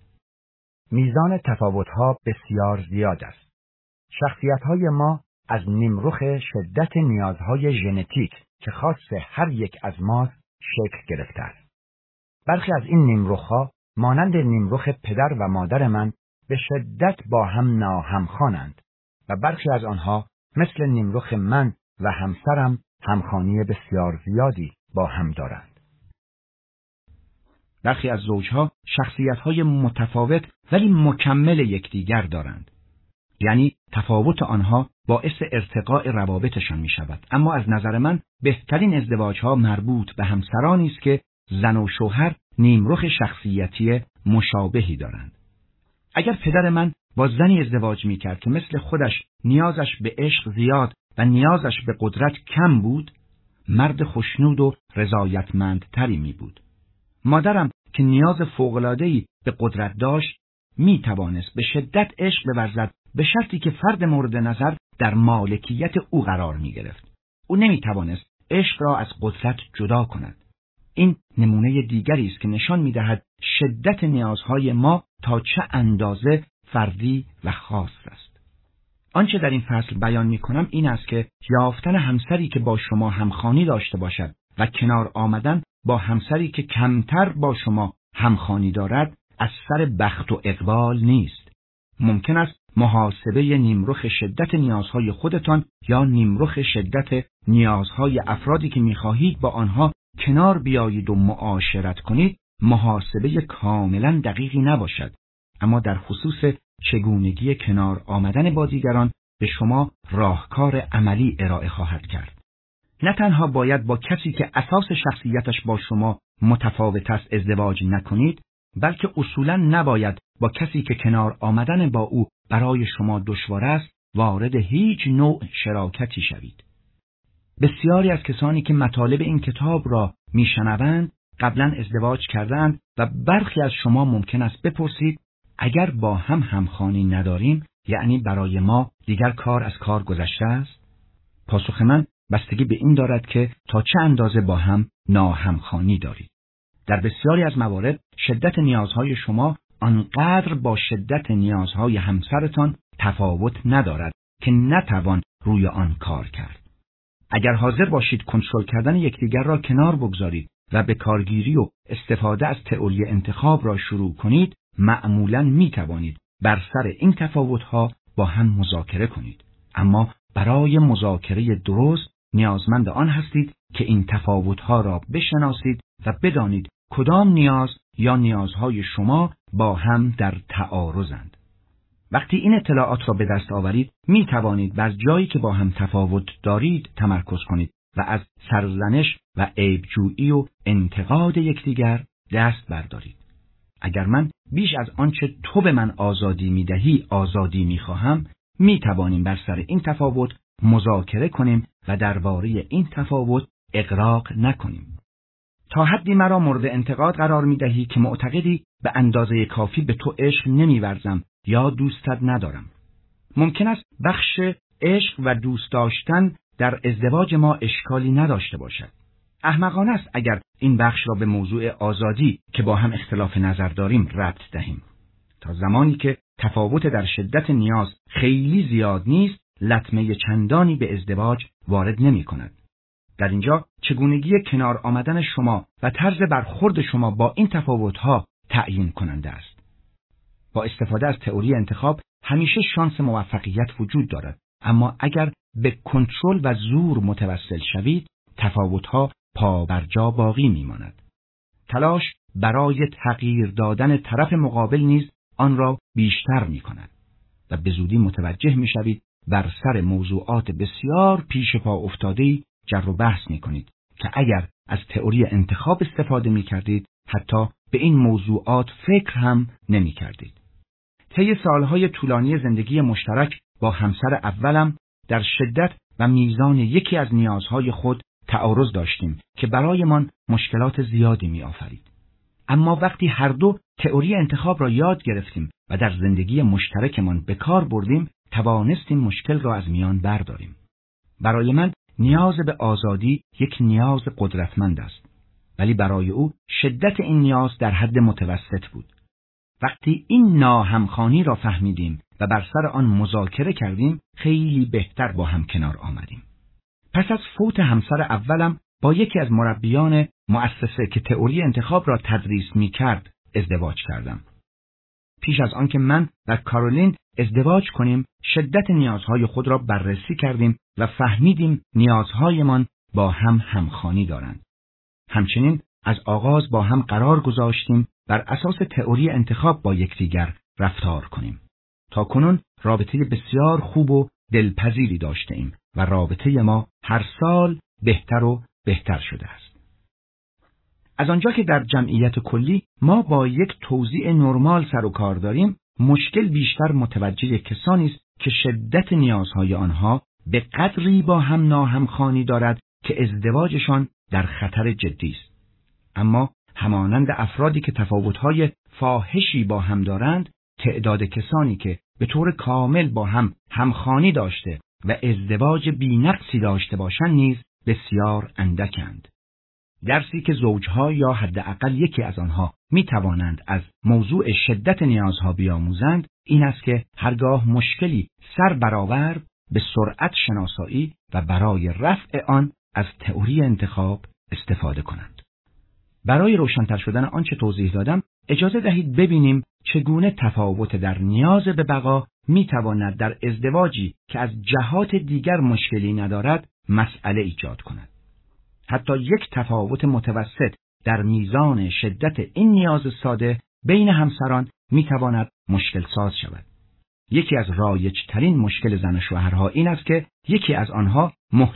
میزان تفاوت‌ها بسیار زیاد است. شخصیت‌های ما از نیمرخ شدت نیازهای ژنتیک که خاص هر یک از ماست شکل گرفته است. برخی از این نیمرخ‌ها مانند نیمرخ پدر و مادر من به شدت با هم ناهمخوانند و برخی از آنها مثل نیمرخ من و همسرم همخوانی بسیار زیادی با هم دارند. برخی از زوجها شخصیت‌های متفاوت ولی مکمل یکدیگر دارند. یعنی تفاوت آنها باعث ارتقاء روابطشان می شود. اما از نظر من بهترین ازدواج‌ها مربوط به همسرانی است که زن و شوهر نیمرخ شخصیتی مشابهی دارند. اگر پدر من با زنی ازدواج می کرد که مثل خودش نیازش به عشق زیاد و نیازش به قدرت کم بود، مرد خوشنود و رضایتمندتری می بود. مادرم که نیاز فوق‌العاده‌ای به قدرت داشت، می توانست به شدت عشق بورزد به شرطی که فرد مورد نظر در مالکیت او قرار می گرفت. او نمی توانست عشق را از قدرت جدا کند. این نمونه دیگری است که نشان می دهد شدت نیازهای ما تا چه اندازه فردی و خاص است. آنچه در این فصل بیان می کنم این است که یافتن همسری که با شما همخوانی داشته باشد و کنار آمدن با همسری که کمتر با شما همخوانی دارد از سر بخت و اقبال نیست. ممکن است محاسبه نیمرخ شدت نیازهای خودتان یا نیمرخ شدت نیازهای افرادی که می‌خواهید با آنها کنار بیایید و معاشرت کنید محاسبه کاملا دقیقی نباشد، اما در خصوص چگونگی کنار آمدن با دیگران به شما راهکار عملی ارائه خواهد کرد. نه تنها باید با کسی که اساس شخصیتش با شما متفاوت است ازدواج نکنید، بلکه اصولاً نباید با کسی که کنار آمدن با او برای شما دشوار است وارد هیچ نوع شراکتی شوید. بسیاری از کسانی که مطالب این کتاب را میشنوند قبلا ازدواج کردند و برخی از شما ممکن است بپرسید اگر با هم همخوانی نداریم یعنی برای ما دیگر کار از کار گذشته است؟ پاسخ من بستگی به این دارد که تا چه اندازه با هم ناهمخوانی دارید. در بسیاری از موارد شدت نیازهای شما آنقدر با شدت نیازهای همسرتان تفاوت ندارد که نتوان روی آن کار کرد. اگر حاضر باشید کنترل کردن یکدیگر را کنار بگذارید و به کارگیری و استفاده از تئوری انتخاب را شروع کنید، معمولاً می توانید بر سر این تفاوت‌ها با هم مذاکره کنید. اما برای مذاکره درست نیازمند آن هستید که این تفاوت‌ها را بشناسید و بدانید کدام نیاز یا نیازهای شما با هم در تعارضند. وقتی این اطلاعات را به دست آورید، می توانید بر جایی که با هم تفاوت دارید تمرکز کنید و از سرزنش و عیبجویی و انتقاد یکدیگر دست بردارید. اگر من بیش از آنچه تو به من آزادی می دهی آزادی می خواهم، می توانیم بر سر این تفاوت مذاکره کنیم و درباره این تفاوت اغراق نکنیم. تا حدی مرا مورد انتقاد قرار می دهی که معتقدی به اندازه کافی به تو عشق نمی ورزم یا دوستت ندارم. ممکن است بخش عشق و دوست داشتن در ازدواج ما اشکالی نداشته باشد. احمقانه است اگر این بخش را به موضوع آزادی که با هم اختلاف نظر داریم ربط دهیم. تا زمانی که تفاوت در شدت نیاز خیلی زیاد نیست، لطمه چندانی به ازدواج وارد نمی کند. در اینجا چگونگی کنار آمدن شما و طرز برخورد شما با این تفاوت‌ها تعیین کننده است. با استفاده از تئوری انتخاب همیشه شانس موفقیت وجود دارد، اما اگر به کنترل و زور متوسل شوید، تفاوت‌ها پا بر جا باقی می‌ماند. تلاش برای تغییر دادن طرف مقابل نیز آن را بیشتر می‌کند و به زودی متوجه می‌شوید بر سر موضوعات بسیار پیش پا افتاده‌ای جر و بحث می‌کنید که اگر از تئوری انتخاب استفاده می‌کردید حتی به این موضوعات فکر هم نمی‌کردید. طی سالهای طولانی زندگی مشترک با همسر اولم در شدت و میزان یکی از نیازهای خود تعارض داشتیم که برایمان مشکلات زیادی می‌آفرید. اما وقتی هر دو تئوری انتخاب را یاد گرفتیم و در زندگی مشترکمان به کار بردیم، توانستیم مشکل را از میان برداریم. برای من نیاز به آزادی یک نیاز قدرتمند است، ولی برای او شدت این نیاز در حد متوسط بود. وقتی این ناهمخوانی را فهمیدیم و بر سر آن مذاکره کردیم، خیلی بهتر با هم کنار آمدیم. پس از فوت همسر اولم با یکی از مربیان مؤسسه که تئوری انتخاب را تدریس می کرد ازدواج کردم. پیش از آن که من و کارولین ازدواج کنیم، شدت نیازهای خود را بررسی کردیم و فهمیدیم نیازهایمان با هم همخوانی دارند. همچنین از آغاز با هم قرار گذاشتیم بر اساس تئوری انتخاب با یکدیگر رفتار کنیم. تا کنون رابطه بسیار خوب و دلپذیری داشته ایم و رابطه ما هر سال بهتر و بهتر شده است. از آنجا که در جمعیت کلی ما با یک توزیع نرمال سر و کار داریم، مشکل بیشتر متوجه کسانی است که شدت نیازهای آنها به قدری با هم ناهمخوانی دارد که ازدواجشان در خطر جدی است. اما همانند افرادی که تفاوت‌های فاحشی با هم دارند، تعداد کسانی که به طور کامل با هم همخوانی داشته و ازدواج بی‌نقصی داشته باشند نیز بسیار اندکند. درسی که زوجها یا حداقل یکی از آنها می توانند از موضوع شدت نیازها بیاموزند این است که هرگاه مشکلی سر برآورد به سرعت شناسایی و برای رفع آن از تئوری انتخاب استفاده کنند. برای روشن‌تر شدن آنچه توضیح دادم، اجازه دهید ببینیم چگونه تفاوت در نیاز به بقا می تواند در ازدواجی که از جهات دیگر مشکلی ندارد مسئله ایجاد کند. حتی یک تفاوت متوسط در میزان شدت این نیاز ساده بین همسران می تواند مشکل ساز شود. یکی از رایج ترین مشکل زن و شوهرها این است که یکی از آنها محتاط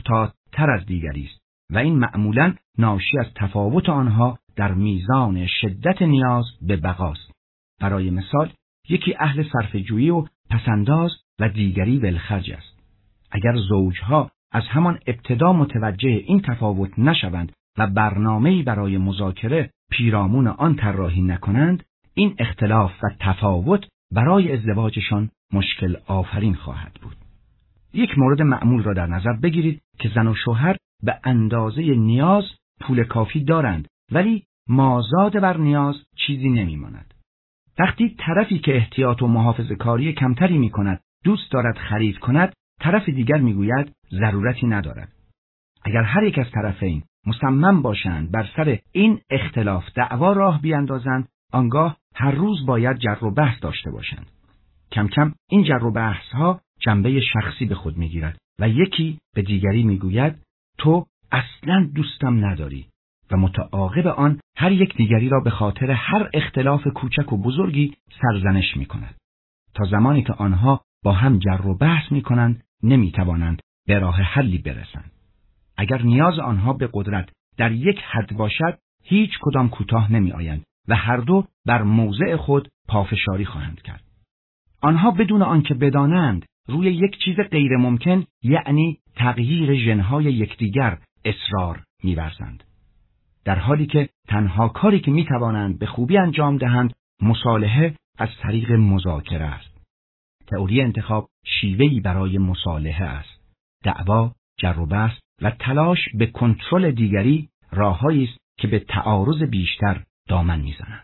تر از دیگری است و این معمولاً ناشی از تفاوت آنها در میزان شدت نیاز به بقاست. برای مثال، یکی اهل صرفه‌جویی و پسنداز و دیگری ولخرج است. اگر زوجها از همان ابتدا متوجه این تفاوت نشوند و برنامه‌ای برای مذاکره پیرامون آن طراحی نکنند، این اختلاف و تفاوت برای ازدواجشان مشکل آفرین خواهد بود. یک مورد معمول را در نظر بگیرید که زن و شوهر به اندازه نیاز پول کافی دارند، ولی مازاد بر نیاز چیزی نمی‌ماند. وقتی طرفی که احتیاط و محافظه‌کاری کمتری می‌کند دوست دارد خرید کند، طرف دیگر می‌گوید ضرورتی ندارد. اگر هر یک از طرفین مصمم باشند بر سر این اختلاف دعوا راه بیاندازند، آنگاه هر روز باید جر و بحث داشته باشند. کم کم این جر و بحث‌ها جنبه شخصی به خود می‌گیرد و یکی به دیگری می‌گوید تو اصلاً دوستم نداری و متعاقب آن هر یک دیگری را به خاطر هر اختلاف کوچک و بزرگی سرزنش می‌کند. تا زمانی که آنها با هم جر و بحث می‌کنند نمی‌توانند به راه حلی برسند. اگر نیاز آنها به قدرت در یک حد باشد، هیچ کدام کوتاه نمی‌آیند و هر دو بر موضع خود پافشاری خواهند کرد. آنها بدون آنکه بدانند روی یک چیز غیر ممکن، یعنی تغییر ژن‌های یکدیگر، اصرار می‌ورزند. در حالی که تنها کاری که می‌توانند به خوبی انجام دهند مصالحه از طریق مذاکره است. تئوری انتخاب شیوهی برای مصالحه است. دعوا، جر و بحث و تلاش به کنترل دیگری راه‌هایی است که به تعارض بیشتر دامن می‌زنند.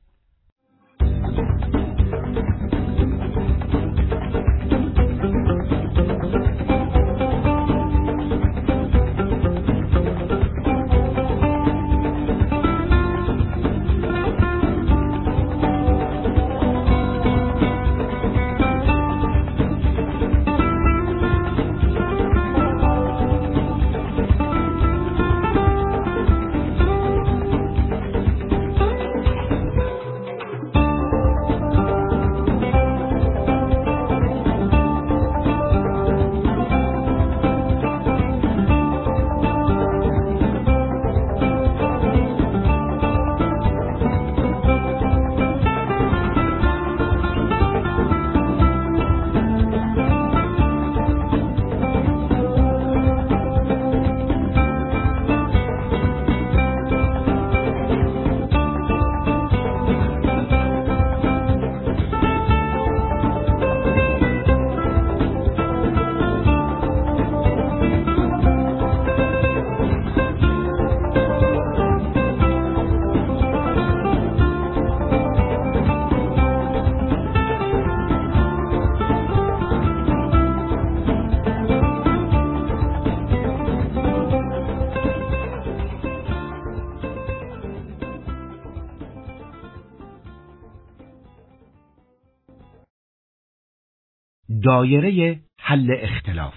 دایره حل اختلاف.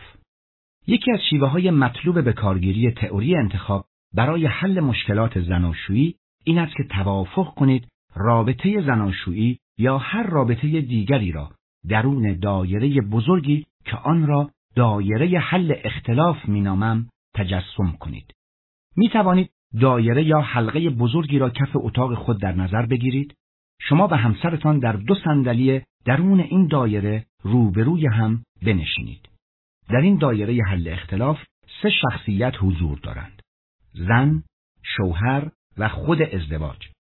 یکی از شیوه‌های مطلوب به کارگیری تئوری انتخاب برای حل مشکلات زناشویی این است که توافق کنید رابطه زناشویی یا هر رابطه دیگری را درون دایره بزرگی که آن را دایره حل اختلاف مینامم تجسم کنید. می توانید دایره یا حلقه بزرگی را کف اتاق خود در نظر بگیرید. شما و همسرتان در دو صندلی درون این دایره روبروی هم بنشینید. در این دایره حل اختلاف سه شخصیت حضور دارند: زن، شوهر و خود ازدواج.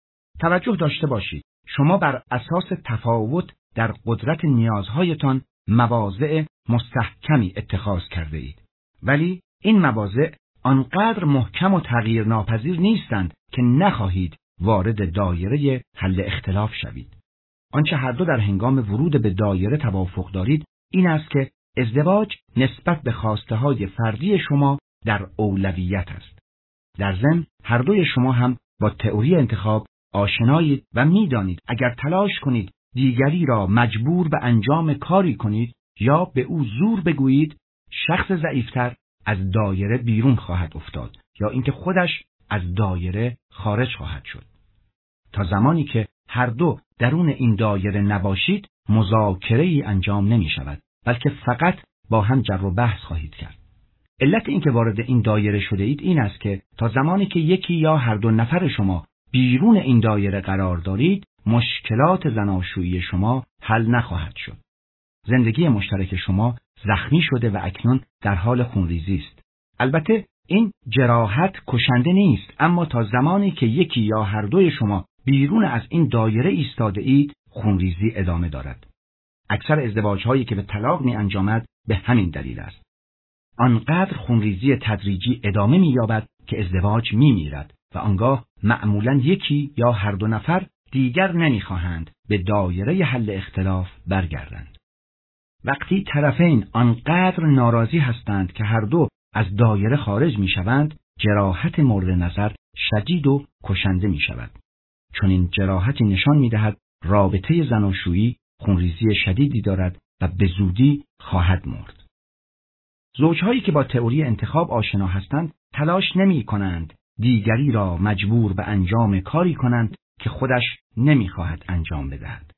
توجه داشته باشید، شما بر اساس تفاوت در قدرت نیازهایتان مواضع مستحکمی اتخاذ کرده اید، ولی این مواضع آنقدر محکم و تغییر ناپذیر نیستند که نخواهید وارد دایره حل اختلاف شوید. آنچه هر دو در هنگام ورود به دایره توافق دارید این است که ازدواج نسبت به خواسته‌های فردی شما در اولویت است. در ضمن هر دوی شما هم با تئوری انتخاب آشنایید و می‌دانید اگر تلاش کنید دیگری را مجبور به انجام کاری کنید یا به او زور بگویید، شخص ضعیفتر از دایره بیرون خواهد افتاد یا اینکه خودش از دایره خارج خواهد شد. تا زمانی که هر دو درون این دایره نباشید، مذاکره‌ای انجام نمی شود، بلکه فقط با هم جر و بحث خواهید کرد. علت اینکه وارد این دایره شده اید این است که تا زمانی که یکی یا هر دو نفر شما بیرون این دایره قرار دارید، مشکلات زناشویی شما حل نخواهد شد. زندگی مشترک شما زخمی شده و اکنون در حال خونریزی است. البته این جراحت کشنده نیست، اما تا زمانی که یکی یا هر دوی شما بیرون از این دایره ایستاده اید، خونریزی ادامه دارد. اکثر ازدواج‌هایی که به طلاق می انجامد به همین دلیل است. آنقدر خونریزی تدریجی ادامه می‌یابد که ازدواج می‌میرد و آنگاه معمولاً یکی یا هر دو نفر دیگر نمی‌خواهند به دایره حل اختلاف برگردند. وقتی طرفین آنقدر ناراضی هستند که هر دو از دایره خارج می‌شوند، جراحت مورد نظر شدید و کشنده می‌شود. چون این جراحتی نشان می‌دهد رابطه زناشویی خونریزی شدیدی دارد و به زودی خواهد مرد. زوجهایی که با تئوری انتخاب آشنا هستند تلاش نمی کنند دیگری را مجبور به انجام کاری کنند که خودش نمی خواهد انجام بدهد.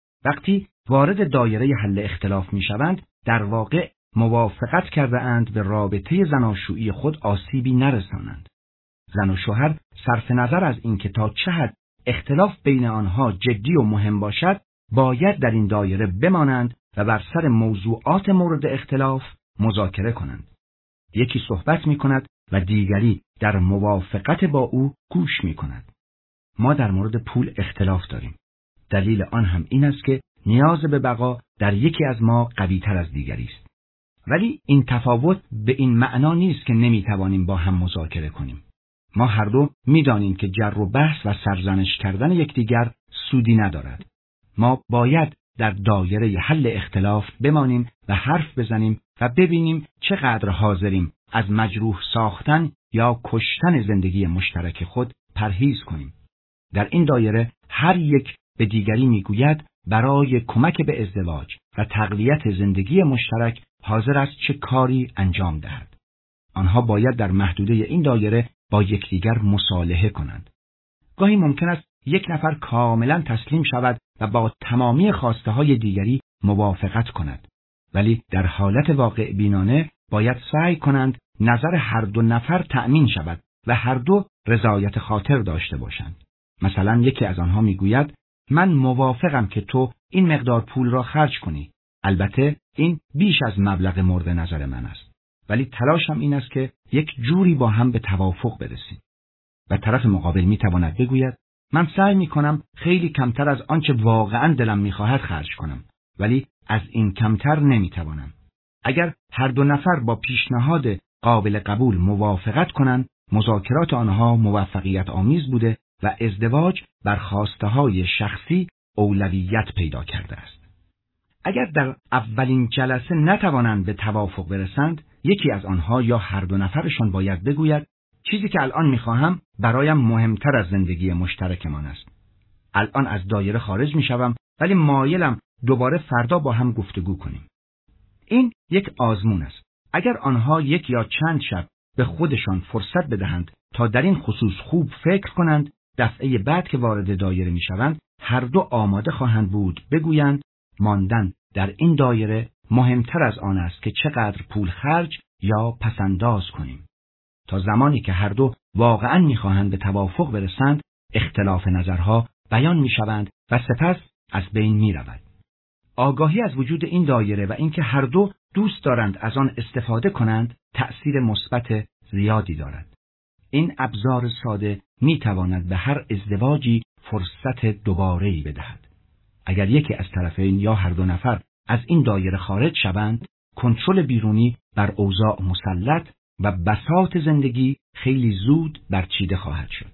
وقتی وارد دایره حل اختلاف می شوند، در واقع موافقت کرده اند به رابطه زناشویی خود آسیبی نرسانند. زن و شوهر صرف نظر از اینکه تا چه حد اختلاف بین آنها جدی و مهم باشد، باید در این دایره بمانند و بر سر موضوعات مورد اختلاف مذاکره کنند. یکی صحبت می کند و دیگری در موافقت با او گوش می کند. ما در مورد پول اختلاف داریم. دلیل آن هم این است که نیاز به بقا در یکی از ما قوی تر از دیگری است. ولی این تفاوت به این معنا نیست که نمی توانیم با هم مذاکره کنیم. ما هر دو می دانیم که جر و بحث و سرزنش کردن یکدیگر سودی ندارد. ما باید در دایره حل اختلاف بمانیم و حرف بزنیم و ببینیم چقدر حاضریم از مجروح ساختن یا کشتن زندگی مشترک خود پرهیز کنیم. در این دایره هر یک به دیگری میگوید برای کمک به ازدواج و تقویت زندگی مشترک حاضر است چه کاری انجام دهد. آنها باید در محدوده این دایره با یکدیگر مصالحه کنند. گاهی ممکن است یک نفر کاملا تسلیم شود و با تمامی خواسته های دیگری موافقت کند. ولی در حالت واقع بینانه باید سعی کنند نظر هر دو نفر تأمین شود و هر دو رضایت خاطر داشته باشند. مثلا یکی از آنها میگوید من موافقم که تو این مقدار پول را خرج کنی. البته این بیش از مبلغ مورد نظر من است. ولی تلاشم این است که یک جوری با هم به توافق برسیم. و طرف مقابل میتواند بگوید من سعی میکنم خیلی کمتر از آنچه واقعا دلم میخواهد خرج کنم، ولی از این کمتر نمیتوانم. اگر هر دو نفر با پیشنهاد قابل قبول موافقت کنند، مذاکرات آنها موفقیت آمیز بوده و ازدواج بر خواسته های شخصی اولویت پیدا کرده است. اگر در اولین جلسه نتوانند به توافق برسند، یکی از آنها یا هر دو نفرشان باید بگوید چیزی که الان میخواهم برایم مهمتر از زندگی مشترکمان است. الان از دایره خارج میشوم، ولی مایلم دوباره فردا با هم گفتگو کنیم. این یک آزمون است. اگر آنها یک یا چند شب به خودشان فرصت بدهند تا در این خصوص خوب فکر کنند، دفعه بعد که وارد دایره میشوند هر دو آماده خواهند بود بگویند ماندن در این دایره مهمتر از آن است که چقدر پول خرج یا پسنداز کنیم. تا زمانی که هر دو واقعاً میخواهند به توافق برسند، اختلاف نظرها بیان میشوند و سپس از بین میرود. آگاهی از وجود این دایره و اینکه هر دو دوست دارند از آن استفاده کنند، تأثیر مثبت زیادی دارد. این ابزار ساده میتواند به هر ازدواجی فرصت دوباره‌ای بدهد. اگر یکی از طرفین یا هر دو نفر از این دایره خارج شوند، کنترل بیرونی بر اوضاع مسلط و بساط زندگی خیلی زود برچیده خواهد شد.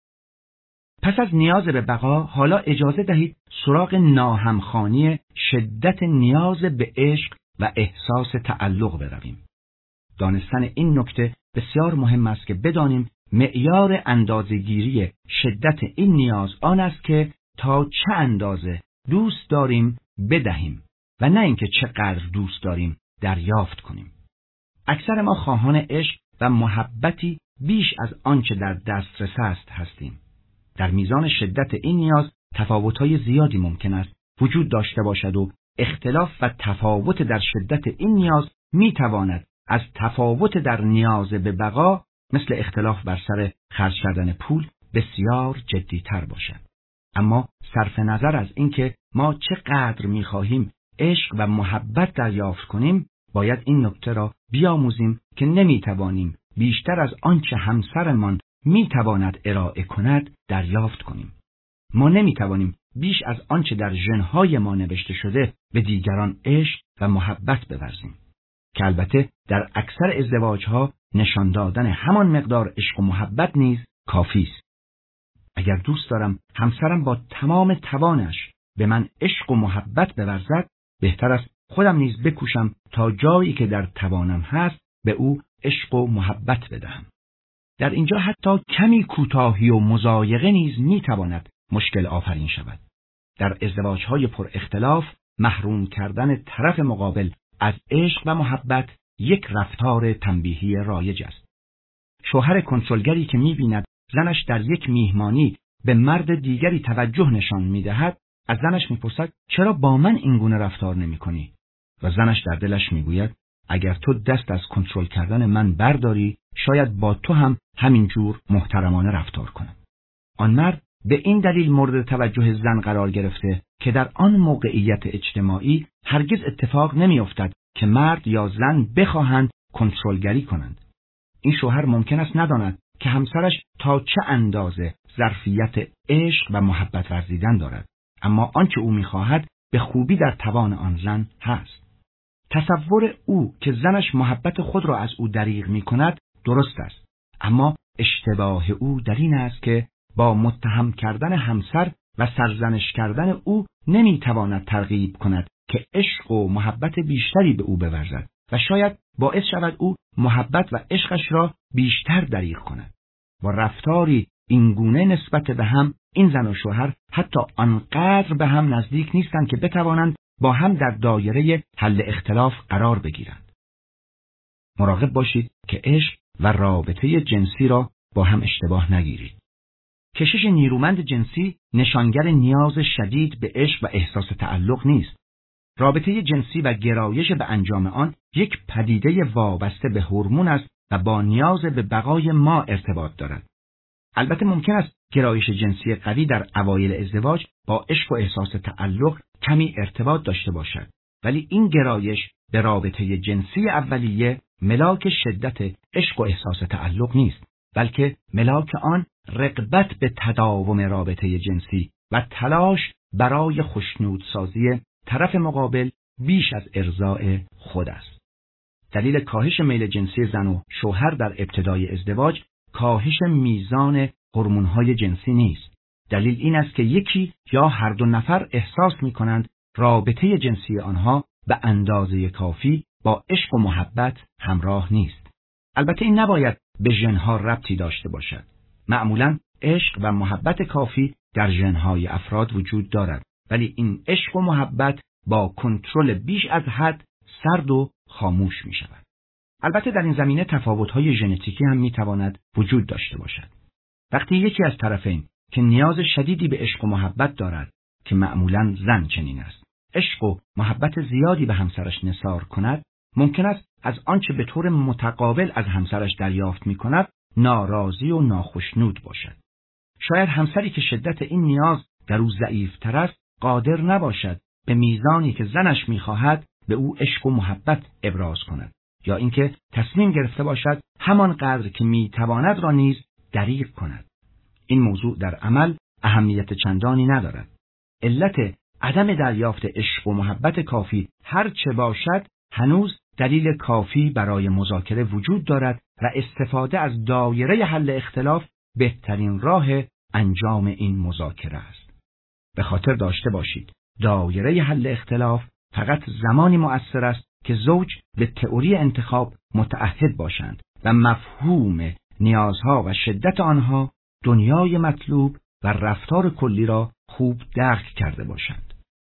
پس از نیاز به بقا، حالا اجازه دهید سراغ ناهمخوانی شدت نیاز به عشق و احساس تعلق برویم. دانستن این نکته بسیار مهم است که بدانیم معیار اندازه‌گیری شدت این نیاز آن است که تا چه اندازه دوست داریم بدهیم و نه اینکه چقدر دوست داریم دریافت کنیم. اکثر ما خواهان عشق و محبتی بیش از آنچه در دسترس است هستیم. در میزان شدت این نیاز تفاوت‌های زیادی ممکن است وجود داشته باشد و اختلاف و تفاوت در شدت این نیاز می‌تواند از تفاوت در نیاز به بقا مثل اختلاف بر سر خرج کردن پول بسیار جدی‌تر باشد. اما صرف نظر از اینکه ما چقدر می‌خواهیم عشق و محبت دریافت کنیم، باید این نکته را بیاموزیم که نمی‌توانیم بیشتر از آنچه همسرمان می‌تواند ارائه کند دریافت کنیم. ما نمی‌توانیم بیش از آنچه در ژن‌های ما نوشته شده به دیگران عشق و محبت بورزیم، که البته در اکثر ازدواج‌ها نشان دادن همان مقدار عشق و محبت نیز کافی است. اگر دوست دارم همسرم با تمام توانش به من عشق و محبت بورزد، بهتر است خودم نیز بکوشم تا جایی که در توانم هست به او عشق و محبت بدهم. در اینجا حتی کمی کوتاهی و مضایقه نیز میتواند مشکل آفرین شود. در ازدواج‌های پر اختلاف محروم کردن طرف مقابل از عشق و محبت یک رفتار تنبیهی رایج است. شوهر کنترلگری که می‌بیند زنش در یک میهمانی به مرد دیگری توجه نشان می‌دهد، از زنش می‌پرسد چرا با من این گونه رفتار نمی‌کنی؟ و زنش در دلش می‌گوید اگر تو دست از کنترل کردن من برداری، شاید با تو هم همین جور محترمانه رفتار کنم. آن مرد به این دلیل مورد توجه زن قرار گرفته که در آن موقعیت اجتماعی هرگز اتفاق نمی‌افتد که مرد یا زن بخواهند کنترلگری کنند. این شوهر ممکن است نداند که همسرش تا چه اندازه ظرفیت عشق و محبت ورزیدن دارد، اما آنچه او می‌خواهد به خوبی در توان آن زن هست. تصور او که زنش محبت خود را از او دریغ می‌کند درست است، اما اشتباه او در این است که با متهم کردن همسر و سرزنش کردن او نمی‌تواند ترغیب کند که عشق و محبت بیشتری به او بورزد و شاید باعث شود او محبت و عشقش را بیشتر دریغ کند. با رفتاری اینگونه نسبت به هم، این زن و شوهر حتی آنقدر به هم نزدیک نیستند که بتوانند با هم در دایره حل اختلاف قرار بگیرند. مراقب باشید که عشق و رابطه جنسی را با هم اشتباه نگیرید. کشش نیرومند جنسی نشانگر نیاز شدید به عشق و احساس تعلق نیست. رابطه جنسی و گرایش به انجام آن یک پدیده وابسته به هورمون است و با نیاز به بقای ما ارتباط دارد. البته ممکن است گرایش جنسی قوی در اوایل ازدواج با عشق و احساس تعلق کمی ارتباط داشته باشد، ولی این گرایش به رابطه جنسی اولیه ملاک شدت عشق و احساس تعلق نیست، بلکه ملاک آن رغبت به تداوم رابطه جنسی و تلاش برای خوشنودسازی طرف مقابل بیش از ارضاء خود است. دلیل کاهش میل جنسی زن و شوهر در ابتدای ازدواج کاهش میزان هورمون‌های جنسی نیست. دلیل این است که یکی یا هر دو نفر احساس می‌کنند رابطه جنسی آنها به اندازه کافی با عشق و محبت همراه نیست. البته این نباید به ژن‌ها ربطی داشته باشد. معمولاً عشق و محبت کافی در ژن‌های افراد وجود دارد، ولی این عشق و محبت با کنترل بیش از حد سرد و خاموش می‌شود. البته در این زمینه تفاوت‌های ژنتیکی هم می‌تواند وجود داشته باشد. وقتی یکی از طرفین که نیاز شدیدی به عشق و محبت دارد، که معمولاً زن چنین است، عشق و محبت زیادی به همسرش نثار کند، ممکن است از آنچه به طور متقابل از همسرش دریافت می‌کند ناراضی و ناخشنود باشد. شاید همسری که شدت این نیاز در او ضعیف‌تر است قادر نباشد به میزانی که زنش می‌خواهد به او عشق و محبت ابراز کند، یا اینکه تصمیم گرفته باشد همان قدر که می‌تواند را نیز دریغ کند. این موضوع در عمل اهمیت چندانی ندارد. علت عدم دریافت عشق و محبت کافی هر چه باشد، هنوز دلیل کافی برای مذاکره وجود دارد و استفاده از دایره حل اختلاف بهترین راه انجام این مذاکره است. به خاطر داشته باشید دایره حل اختلاف فقط زمانی مؤثر است که زوج به تئوری انتخاب متعهد باشند و مفهوم نیازها و شدت آنها، دنیای مطلوب و رفتار کلی را خوب درک کرده باشند.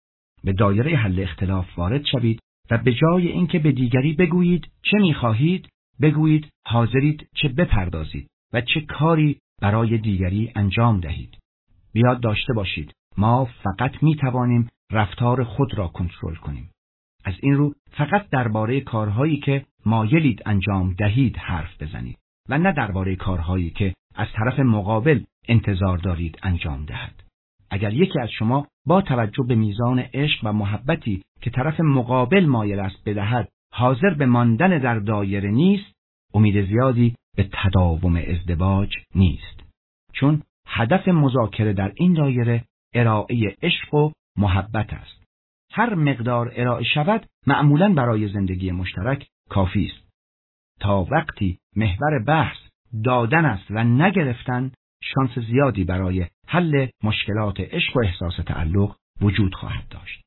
به دایره حل اختلاف وارد شوید و به جای اینکه به دیگری بگویید چه می‌خواهید، بگویید حاضرید چه بپردازید و چه کاری برای دیگری انجام دهید. بیاد داشته باشید ما فقط می‌توانیم رفتار خود را کنترل کنیم. از این رو فقط درباره کارهایی که مایلید انجام دهید حرف بزنید و نه درباره کارهایی که از طرف مقابل انتظار دارید انجام دهد. اگر یکی از شما با توجه به میزان عشق و محبتی که طرف مقابل مایل است بدهد حاضر به ماندن در دایره نیست، امید زیادی به تداوم ازدواج نیست. چون هدف مذاکره در این دایره ارائه عشق و محبت است. هر مقدار ارائه شود معمولاً برای زندگی مشترک کافی است. تا وقتی محور بحث دادن است و نگرفتن، شانس زیادی برای حل مشکلات عشق و احساس تعلق وجود خواهد داشت.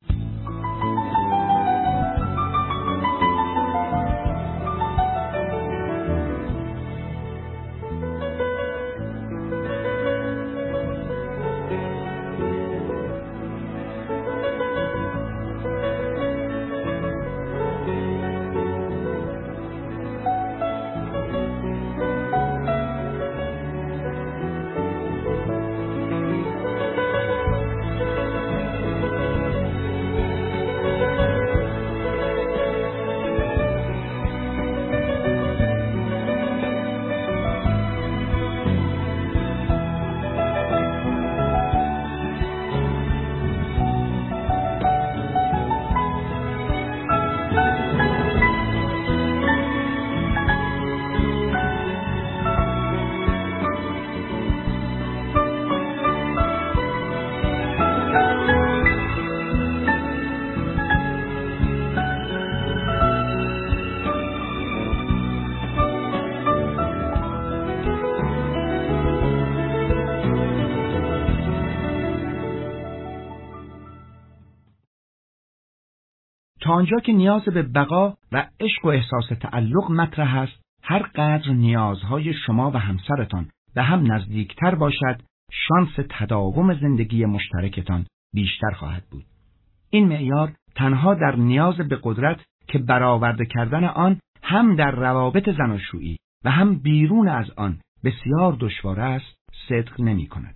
تا آنجا که نیاز به بقا و عشق و احساس تعلق مطرح است، هر قدر نیازهای شما و همسرتان به هم نزدیکتر باشد، شانس تداوم زندگی مشترکتان بیشتر خواهد بود. این معیار تنها در نیاز به قدرت که برآورده کردن آن هم در روابط زناشویی و هم بیرون از آن بسیار دشوار است، صدق نمی کند.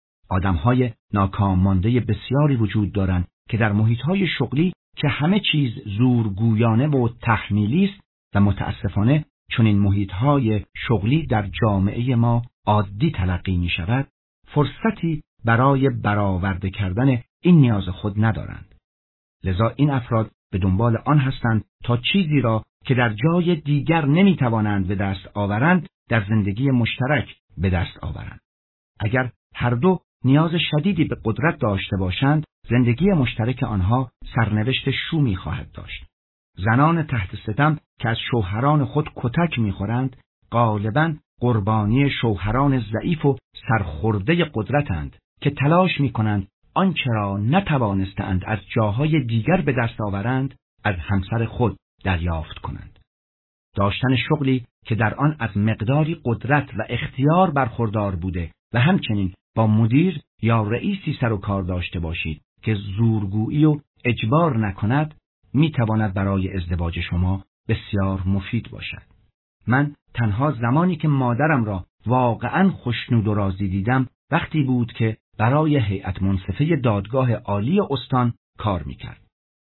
آدمهای ناکام مانده بسیاری وجود دارند که در محیطهای شغلی که همه چیز زورگویانه و تحمیلی است و متاسفانه چون این محیطهای شغلی در جامعه ما عادی تلقی می شود، فرصتی برای برآورده کردن این نیاز خود ندارند. لذا این افراد به دنبال آن هستند تا چیزی را که در جای دیگر نمی توانند به دست آورند در زندگی مشترک به دست آورند. اگر هر دو نیاز شدیدی به قدرت داشته باشند، زندگی مشترک آنها سرنوشت شومی خواهد داشت. زنان تحت ستم که از شوهران خود کتک می‌خورند، غالباً قربانی شوهران ضعیف و سرخورده قدرتند که تلاش می‌کنند آنچه را نتوانستند از جاهای دیگر به دست آورند، از همسر خود دریافت کنند. داشتن شغلی که در آن از مقداری قدرت و اختیار برخوردار بوده و همچنین با مدیر یا رئیسی سر و کار داشته باشید که زورگویی و اجبار نکند، میتواند برای ازدواج شما بسیار مفید باشد. من تنها زمانی که مادرم را واقعاً خوشنود و راضی دیدم وقتی بود که برای هیئت منصفه دادگاه عالی استان کار میکرد.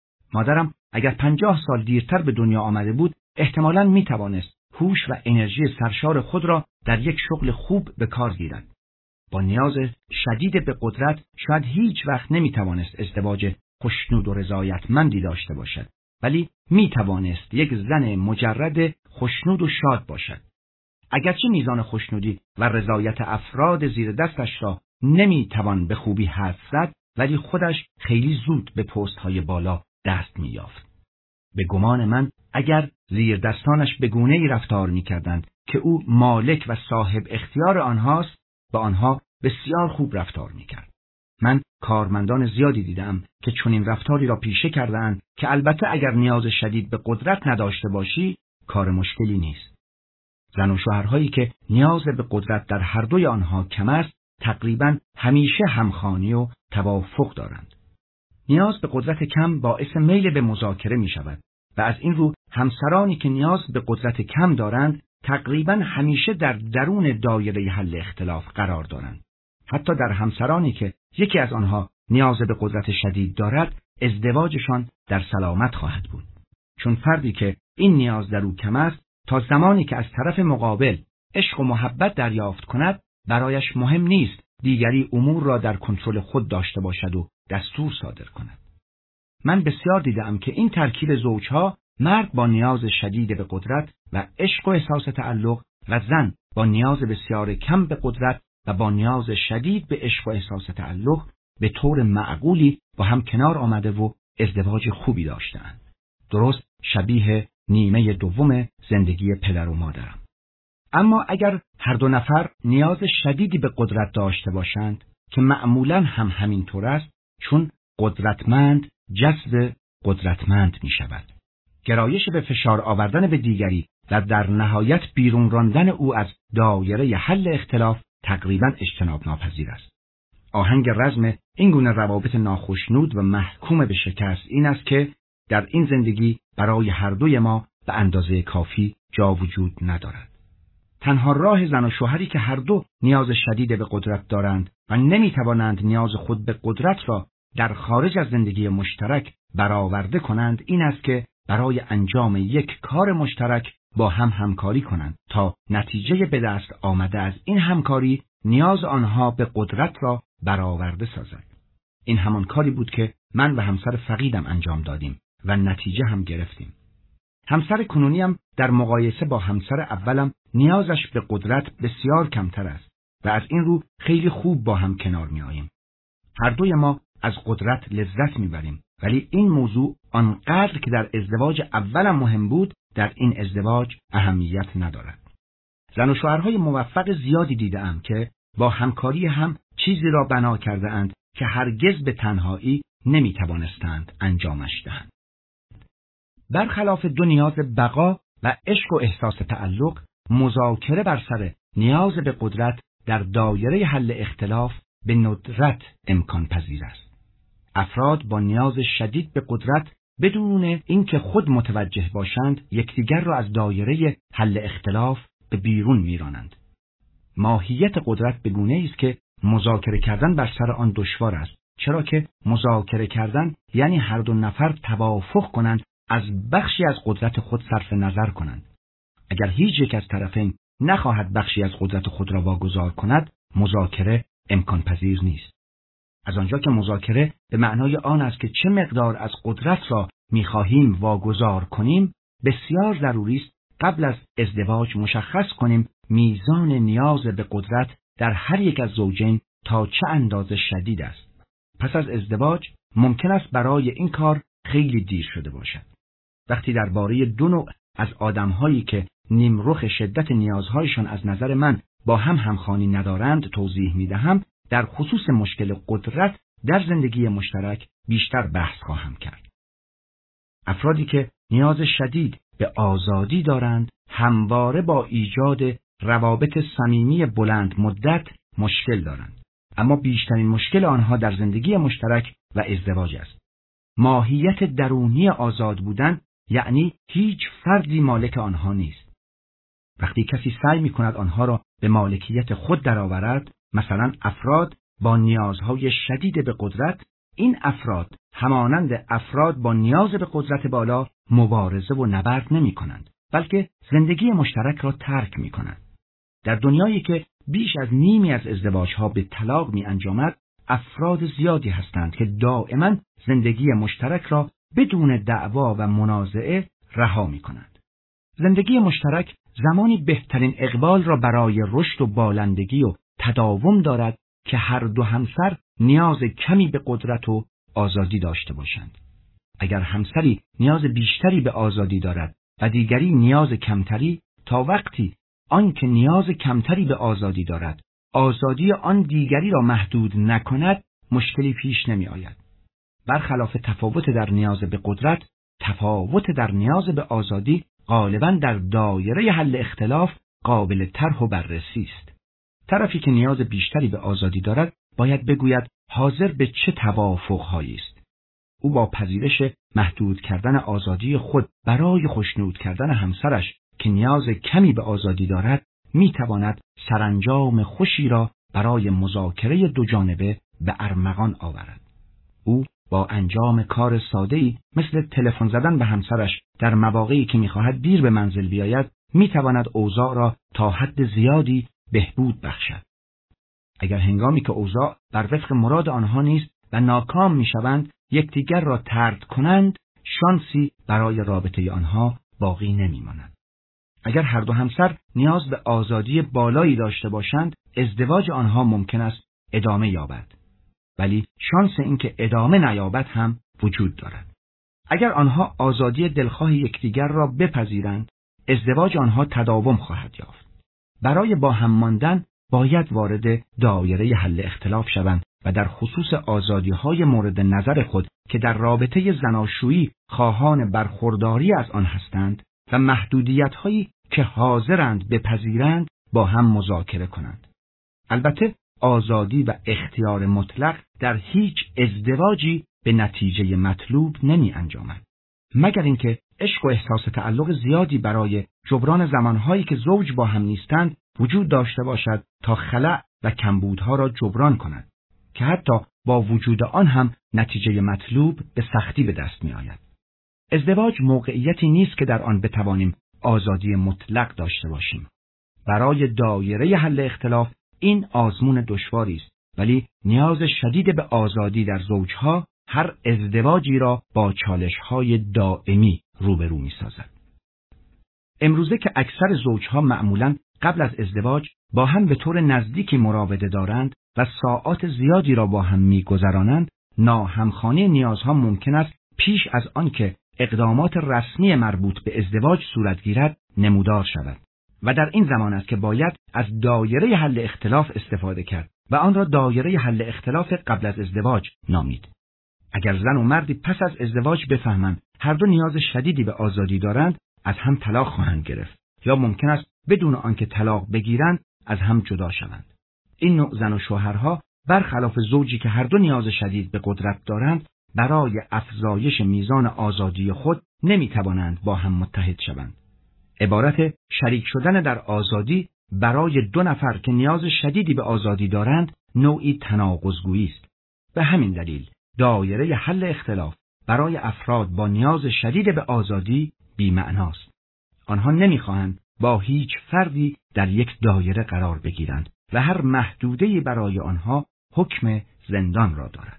مادرم اگر پنجاه سال دیرتر به دنیا آمده بود، احتمالاً میتوانست هوش و انرژی سرشار خود را در یک شغل خوب به کار گیرد. با نیاز شدید به قدرت شاید هیچ وقت نمیتوانست ازدواج خوشنود و رضایتمندی داشته باشد، ولی میتوانست یک زن مجرد خوشنود و شاد باشد. اگرچه میزان خوشنودی و رضایت افراد زیر دستش را نمیتوان به خوبی حدس زد، ولی خودش خیلی زود به پست‌های بالا دست می‌یافت. به گمان من اگر زیر دستانش به گونه‌ای رفتار می‌کردند که او مالک و صاحب اختیار آنهاست، با آنها بسیار خوب رفتار می‌کرد. من کارمندان زیادی دیدم که چنین رفتاری را پیشه کردند که البته اگر نیاز شدید به قدرت نداشته باشی، کار مشکلی نیست. زن و شوهرهایی که نیاز به قدرت در هر دوی آنها کم است، تقریباً همیشه همخوانی و توافق دارند. نیاز به قدرت کم باعث میل به مذاکره می شود و از این رو همسرانی که نیاز به قدرت کم دارند تقریباً همیشه در درون دایره حل اختلاف قرار دارند. حتی در همسرانی که یکی از آنها نیاز به قدرت شدید دارد، ازدواجشان در سلامت خواهد بود. چون فردی که این نیاز در او کم است، تا زمانی که از طرف مقابل عشق و محبت دریافت کند، برایش مهم نیست دیگری امور را در کنترل خود داشته باشد و دستور صادر کند. من بسیار دیدم که این ترکیب زوجها، مرد با نیاز شدید به قدرت و عشق و احساس تعلق و زن با نیاز بسیار کم به قدرت و با نیاز شدید به عشق و احساس تعلق، به طور معقولی با هم کنار آمده و ازدواج خوبی داشتند. درست شبیه نیمه دوم زندگی پدر و مادرم. اما اگر هر دو نفر نیاز شدیدی به قدرت داشته باشند، که معمولاً هم همینطور است، چون قدرتمند جذب قدرتمند می شود. گرایش به فشار آوردن به دیگری و در نهایت بیرون راندن او از دایره حل اختلاف تقریباً اجتناب ناپذیر است. آهنگ رزم این گونه روابط ناخوشنود و محکوم به شکست این است که در این زندگی برای هر دوی ما به اندازه کافی جا وجود ندارد. تنها راه زن و شوهری که هر دو نیاز شدید به قدرت دارند و نمیتوانند نیاز خود به قدرت را در خارج از زندگی مشترک برآورده کنند این است که برای انجام یک کار مشترک با هم همکاری کنند تا نتیجه به دست آمده از این همکاری نیاز آنها به قدرت را برآورده سازد. این همان کاری بود که من و همسر فقیدم انجام دادیم و نتیجه هم گرفتیم. همسر کنونیم در مقایسه با همسر اولم نیازش به قدرت بسیار کمتر است و از این رو خیلی خوب با هم کنار می آییم. هر دوی ما از قدرت لذت می بریم، ولی این موضوع آنقدر که در ازدواج اولم مهم بود در این ازدواج اهمیت ندارد. زن و شوهرهای موفق زیادی دیدم که با همکاری هم چیزی را بنا کرده اند که هرگز به تنهایی نمی توانستند انجامش دهند. برخلاف دو نیاز بقا و عشق و احساس تعلق، مذاکره بر سر نیاز به قدرت در دایره حل اختلاف به ندرت امکان پذیر است. افراد با نیاز شدید به قدرت بدون اینکه خود متوجه باشند یکدیگر را از دایره حل اختلاف به بیرون میرانند. ماهیت قدرت به گونه‌ای است که مذاکره کردن بر سر آن دشوار است، چرا که مذاکره کردن یعنی هر دو نفر توافق کنند از بخشی از قدرت خود صرف نظر کنند. اگر هیچ یک از طرفین نخواهد بخشی از قدرت خود را واگذار کند، مذاکره امکان پذیر نیست. از آنجا که مذاکره به معنای آن است که چه مقدار از قدرت را می‌خواهیم واگذار کنیم، بسیار ضروری است قبل از ازدواج مشخص کنیم میزان نیاز به قدرت در هر یک از زوجین تا چه اندازه شدید است. پس از ازدواج ممکن است برای این کار خیلی دیر شده باشد. وقتی درباره دو نوع از آدم‌هایی که نیمرخ شدت نیازهایشان از نظر من با هم همخوانی ندارند توضیح می‌دهم، در خصوص مشکل قدرت در زندگی مشترک بیشتر بحث خواهم کرد. افرادی که نیاز شدید به آزادی دارند همواره با ایجاد روابط صمیمی بلند مدت مشکل دارند، اما بیشترین مشکل آنها در زندگی مشترک و ازدواج است. ماهیت درونی آزاد بودن یعنی هیچ فردی مالک آنها نیست. وقتی کسی سعی می‌کند آنها را به مالکیت خود درآورد، مثلا افراد با نیازهای شدید به قدرت، این افراد همانند افراد با نیاز به قدرت بالا مبارزه و نبرد نمی کنند، بلکه زندگی مشترک را ترک می کنند. در دنیایی که بیش از نیمی از ازدواجها به طلاق می انجامد، افراد زیادی هستند که دائما زندگی مشترک را بدون دعوا و منازعه رها می کنند. زندگی مشترک زمانی بهترین اقبال را برای رشد و بالندگی و تداوم دارد که هر دو همسر نیاز کمی به قدرت و آزادی داشته باشند. اگر همسری نیاز بیشتری به آزادی دارد و دیگری نیاز کمتری، تا وقتی آن که نیاز کمتری به آزادی دارد آزادی آن دیگری را محدود نکند، مشکلی پیش نمی آید. برخلاف تفاوت در نیاز به قدرت، تفاوت در نیاز به آزادی غالباً در دایره حل اختلاف قابل طرح و بررسی است. طرفی که نیاز بیشتری به آزادی دارد باید بگوید حاضر به چه توافق‌هایی است. او با پذیرش محدود کردن آزادی خود برای خوشنود کردن همسرش که نیاز کمی به آزادی دارد میتواند سرانجام خوشی را برای مذاکره دو جانبه به ارمغان آورد. او با انجام کار ساده‌ای مثل تلفن زدن به همسرش در مواقعی که می‌خواهد دیر به منزل بیاید، می‌تواند اوضاع را تا حد زیادی بهبود بخشد. اگر هنگامی که اوضاع بر وفق مراد آنها نیست و ناکام می‌شوند، یکدیگر را طرد کنند، شانسی برای رابطه آنها باقی نمی‌ماند. اگر هر دو همسر نیاز به آزادی بالایی داشته باشند، ازدواج آنها ممکن است ادامه یابد. ولی شانس اینکه ادامه نیابد هم وجود دارد. اگر آنها آزادی دلخواه یکدیگر را بپذیرند، ازدواج آنها تداوم خواهد یافت. برای با هم ماندن باید وارد دایره حل اختلاف شوند و در خصوص آزادی‌های مورد نظر خود که در رابطه زناشویی خواهان برخورداری از آن هستند و محدودیت‌هایی که حاضرند بپذیرند با هم مذاکره کنند. البته آزادی و اختیار مطلق در هیچ ازدواجی به نتیجه مطلوب نمی انجامد، مگر اینکه عشق و احساس تعلق زیادی برای جبران زمانهایی که زوج با هم نیستند وجود داشته باشد تا خلأ و کمبودها را جبران کند، که حتی با وجود آن هم نتیجه مطلوب به سختی به دست می آید. ازدواج موقعیتی نیست که در آن بتوانیم آزادی مطلق داشته باشیم. برای دایره حل اختلاف این آزمون دشواری است، ولی نیاز شدید به آزادی در زوجها هر ازدواجی را با چالش‌های دائمی روبرو می‌سازد. امروزه که اکثر زوجها معمولاً قبل از ازدواج با هم به طور نزدیکی مراوده دارند و ساعات زیادی را با هم می‌گذرانند، ناهمخوانی نیازها ممکن است پیش از آن که اقدامات رسمی مربوط به ازدواج صورت گیرد نمودار شود. و در این زمان است که باید از دایره حل اختلاف استفاده کرد و آن را دایره حل اختلاف قبل از ازدواج نامید. اگر زن و مردی پس از ازدواج بفهمند هر دو نیاز شدیدی به آزادی دارند، از هم طلاق خواهند گرفت یا ممکن است بدون آنکه طلاق بگیرند از هم جدا شوند. این نوع زن و شوهرها برخلاف زوجی که هر دو نیاز شدید به قدرت دارند، برای افزایش میزان آزادی خود نمیتوانند با هم متحد شوند. عبارت شریک شدن در آزادی برای دو نفر که نیاز شدیدی به آزادی دارند نوعی تناقض‌گویی است. به همین دلیل دایره حل اختلاف برای افراد با نیاز شدید به آزادی بی‌معناست. آنها نمی‌خواهند با هیچ فردی در یک دایره قرار بگیرند و هر محدوده‌ای برای آنها حکم زندان را دارد.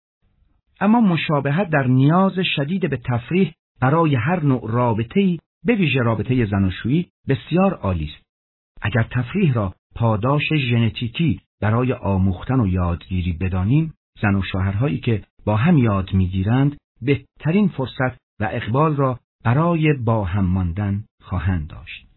اما مشابهت در نیاز شدید به تفریح برای هر نوع رابطه‌ای، به ویژه رابطه زناشویی، بسیار عالی است. اگر تفریح را پاداش ژنتیکی برای آموختن و یادگیری بدانیم، زن و شوهرهایی که با هم یاد می‌گیرند بهترین فرصت و اقبال را برای با هم ماندن خواهند داشت.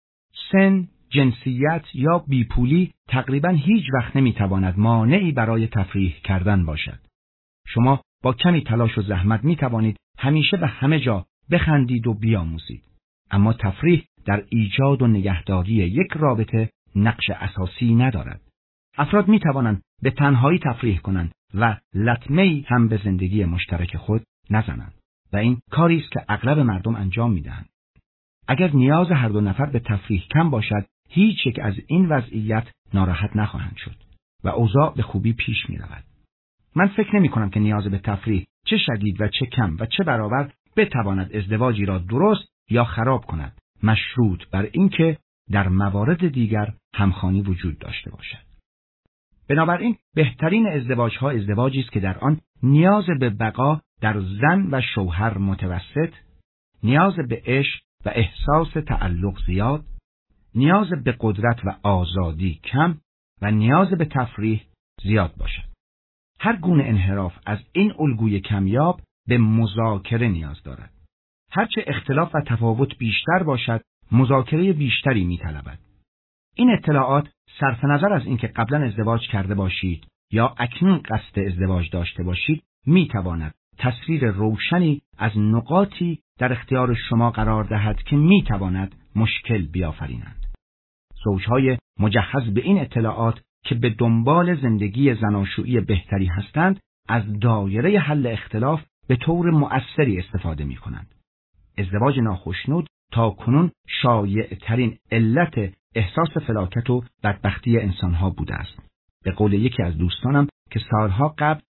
سن، جنسیت یا بیپولی تقریباً هیچ وقت نمی‌تواند مانعی برای تفریح کردن باشد. شما با کمی تلاش و زحمت می‌توانید همیشه به همه جا بخندید و بیاموزید. اما تفریح در ایجاد و نگهداری یک رابطه نقش اساسی ندارد. افراد می توانند به تنهایی تفریح کنند و لطمه‌ای هم به زندگی مشترک خود نزنند و این کاری است که اغلب مردم انجام می دهند. اگر نیاز هر دو نفر به تفریح کم باشد، هیچ یک از این وضعیت ناراحت نخواهند شد و اوضاع به خوبی پیش می رود. من فکر نمی کنم که نیاز به تفریح چه شدید و چه کم و چه برابر بتواند ازدواجی را درست یا خراب کند، مشروط بر اینکه در موارد دیگر همخوانی وجود داشته باشد. بنابراین بهترین ازدواج‌ها ازدواجی است که در آن نیاز به بقا در زن و شوهر متوسط، نیاز به عشق و احساس تعلق زیاد، نیاز به قدرت و آزادی کم و نیاز به تفریح زیاد باشد. هر گونه انحراف از این الگوی کمیاب به مذاکره نیاز دارد. هرچه اختلاف و تفاوت بیشتر باشد، مذاکره بیشتری می‌طلبد. این اطلاعات صرف نظر از اینکه قبلا ازدواج کرده باشید یا اکنون قصد ازدواج داشته باشید، می‌تواند تصویر روشنی از نقاطی در اختیار شما قرار دهد که می‌تواند مشکل بیافرینند. زوجهای مجهز به این اطلاعات که به دنبال زندگی زناشویی بهتری هستند، از دایره حل اختلاف به طور مؤثری استفاده می‌کنند. ازدواج ناخشنود تا کنون شایع ترین علت احساس فلاکت و بدبختی انسانها بوده است. به قول یکی از دوستانم که سالها قبل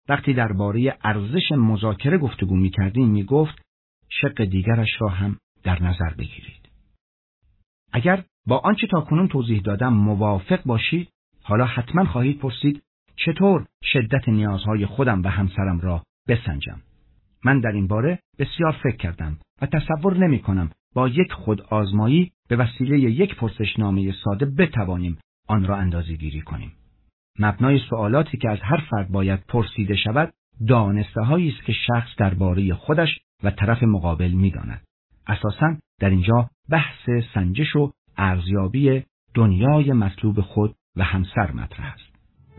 وقتی درباره ارزش مذاکره گفتگو می‌کردیم می‌گفت شق دیگرش را هم در نظر بگیرید. اگر با آنچه تاکنون توضیح دادم موافق باشید، حالا حتما خواهید پرسید چطور شدت نیازهای خودم و همسرم را بسنجم. من در این باره بسیار فکر کردم و تصور نمی کنم با یک خود آزمایی به وسیله یک پرسشنامه ساده بتوانیم آن را اندازه گیری کنیم. مبنای سوالاتی که از هر فرد باید پرسیده شود، دانسته هایی است که شخص درباره خودش و طرف مقابل می داند. اساساً در اینجا بحث سنجش و ارزیابی دنیای مطلوب خود و همسر مطرح است.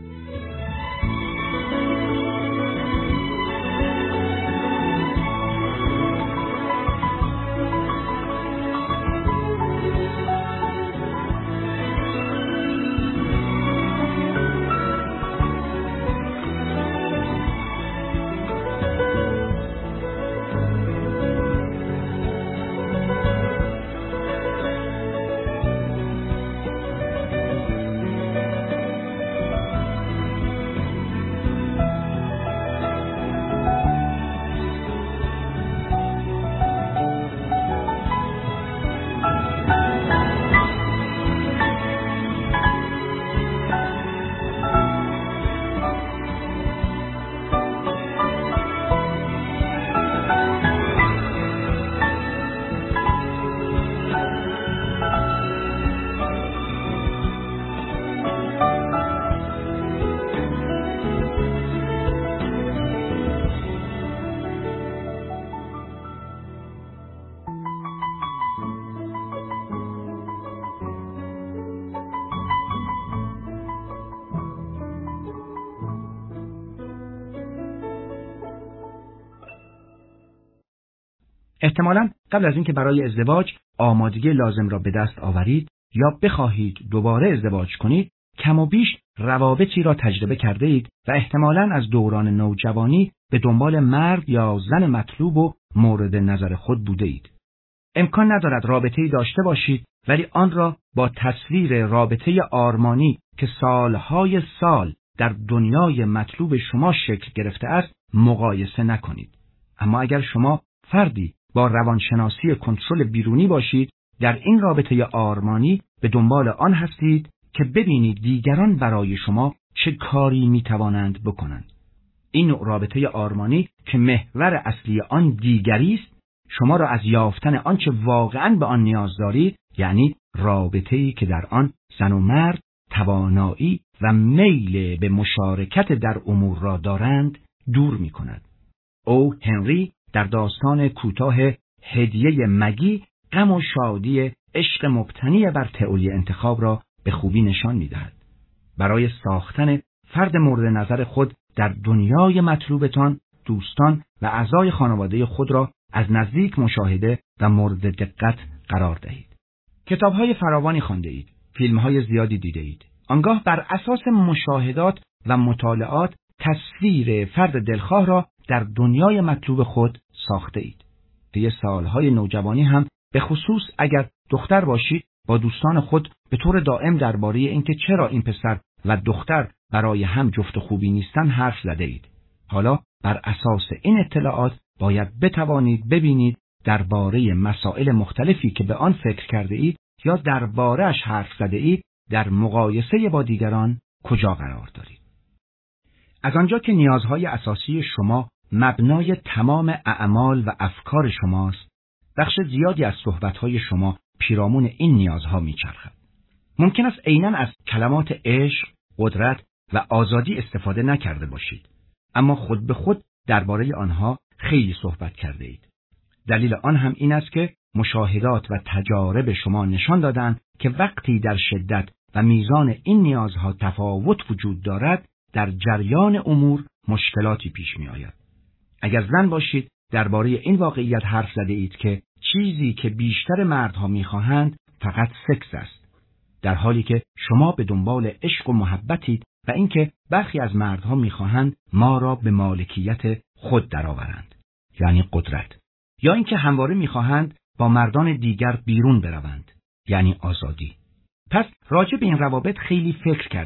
احتمالاً قبل از اینکه برای ازدواج آمادگی لازم را به دست آورید یا بخواهید دوباره ازدواج کنید، کم و بیش روابطی را تجربه کرده اید و احتمالاً از دوران نوجوانی به دنبال مرد یا زن مطلوب و مورد نظر خود بوده اید. امکان ندارد رابطه‌ای داشته باشید ولی آن را با تصویر رابطه آرمانی که سالهای سال در دنیای مطلوب شما شکل گرفته است مقایسه نکنید. اما اگر شما فردی با روانشناسی کنترل بیرونی باشید، در این رابطه آرمانی به دنبال آن هستید که ببینید دیگران برای شما چه کاری میتوانند بکنند. این نوع رابطه آرمانی که محور اصلی آن دیگری است، شما را از یافتن آنچه واقعاً به آن نیاز دارید، یعنی رابطه‌ای که در آن زن و مرد توانایی و میل به مشارکت در امور را دارند، دور می‌کند. او هنری در داستان کوتاه هدیه مگی غم و شادی عشق مبتنی بر تئوری انتخاب را به خوبی نشان می‌دهد. برای ساختن فرد مورد نظر خود در دنیای مطلوبتان، دوستان و اعضای خانواده خود را از نزدیک مشاهده و مورد دقت قرار دهید. کتاب‌های فراوانی خوانده اید، فیلم‌های زیادی دیده اید. آنگاه بر اساس مشاهدات و مطالعات تصویر فرد دلخواه را در دنیای مطلوب خود ساخته اید. طی سالهای نوجوانی هم به خصوص اگر دختر باشید با دوستان خود به طور دائم درباره اینکه چرا این پسر و دختر برای هم جفت خوبی نیستن حرف زده اید. حالا بر اساس این اطلاعات باید بتوانید ببینید درباره مسائل مختلفی که به آن فکر کرده اید یا درباره‌اش حرف زده اید در مقایسه با دیگران کجا قرار دارید. از آنجا که نیازهای اساسی شما مبنای تمام اعمال و افکار شماست، بخش زیادی از صحبت‌های شما پیرامون این نیازها می‌چرخد. ممکن است عیناً از کلمات عشق، قدرت و آزادی استفاده نکرده باشید، اما خود به خود درباره آنها خیلی صحبت کرده اید. دلیل آن هم این است که مشاهدات و تجارب شما نشان دادند که وقتی در شدت و میزان این نیازها تفاوت وجود دارد، در جریان امور مشکلاتی پیش می آید. اگر زن باشید درباره این واقعیت حرف زده اید که چیزی که بیشتر مردها می خواهند فقط سکس است، در حالی که شما به دنبال عشق و محبتید و اینکه برخی از مردها می خواهند ما را به مالکیت خود درآورند، یعنی قدرت، یا اینکه همواره می خواهند با مردان دیگر بیرون بروند، یعنی آزادی. پس راجع به این روابط خیلی فکر کرده اید.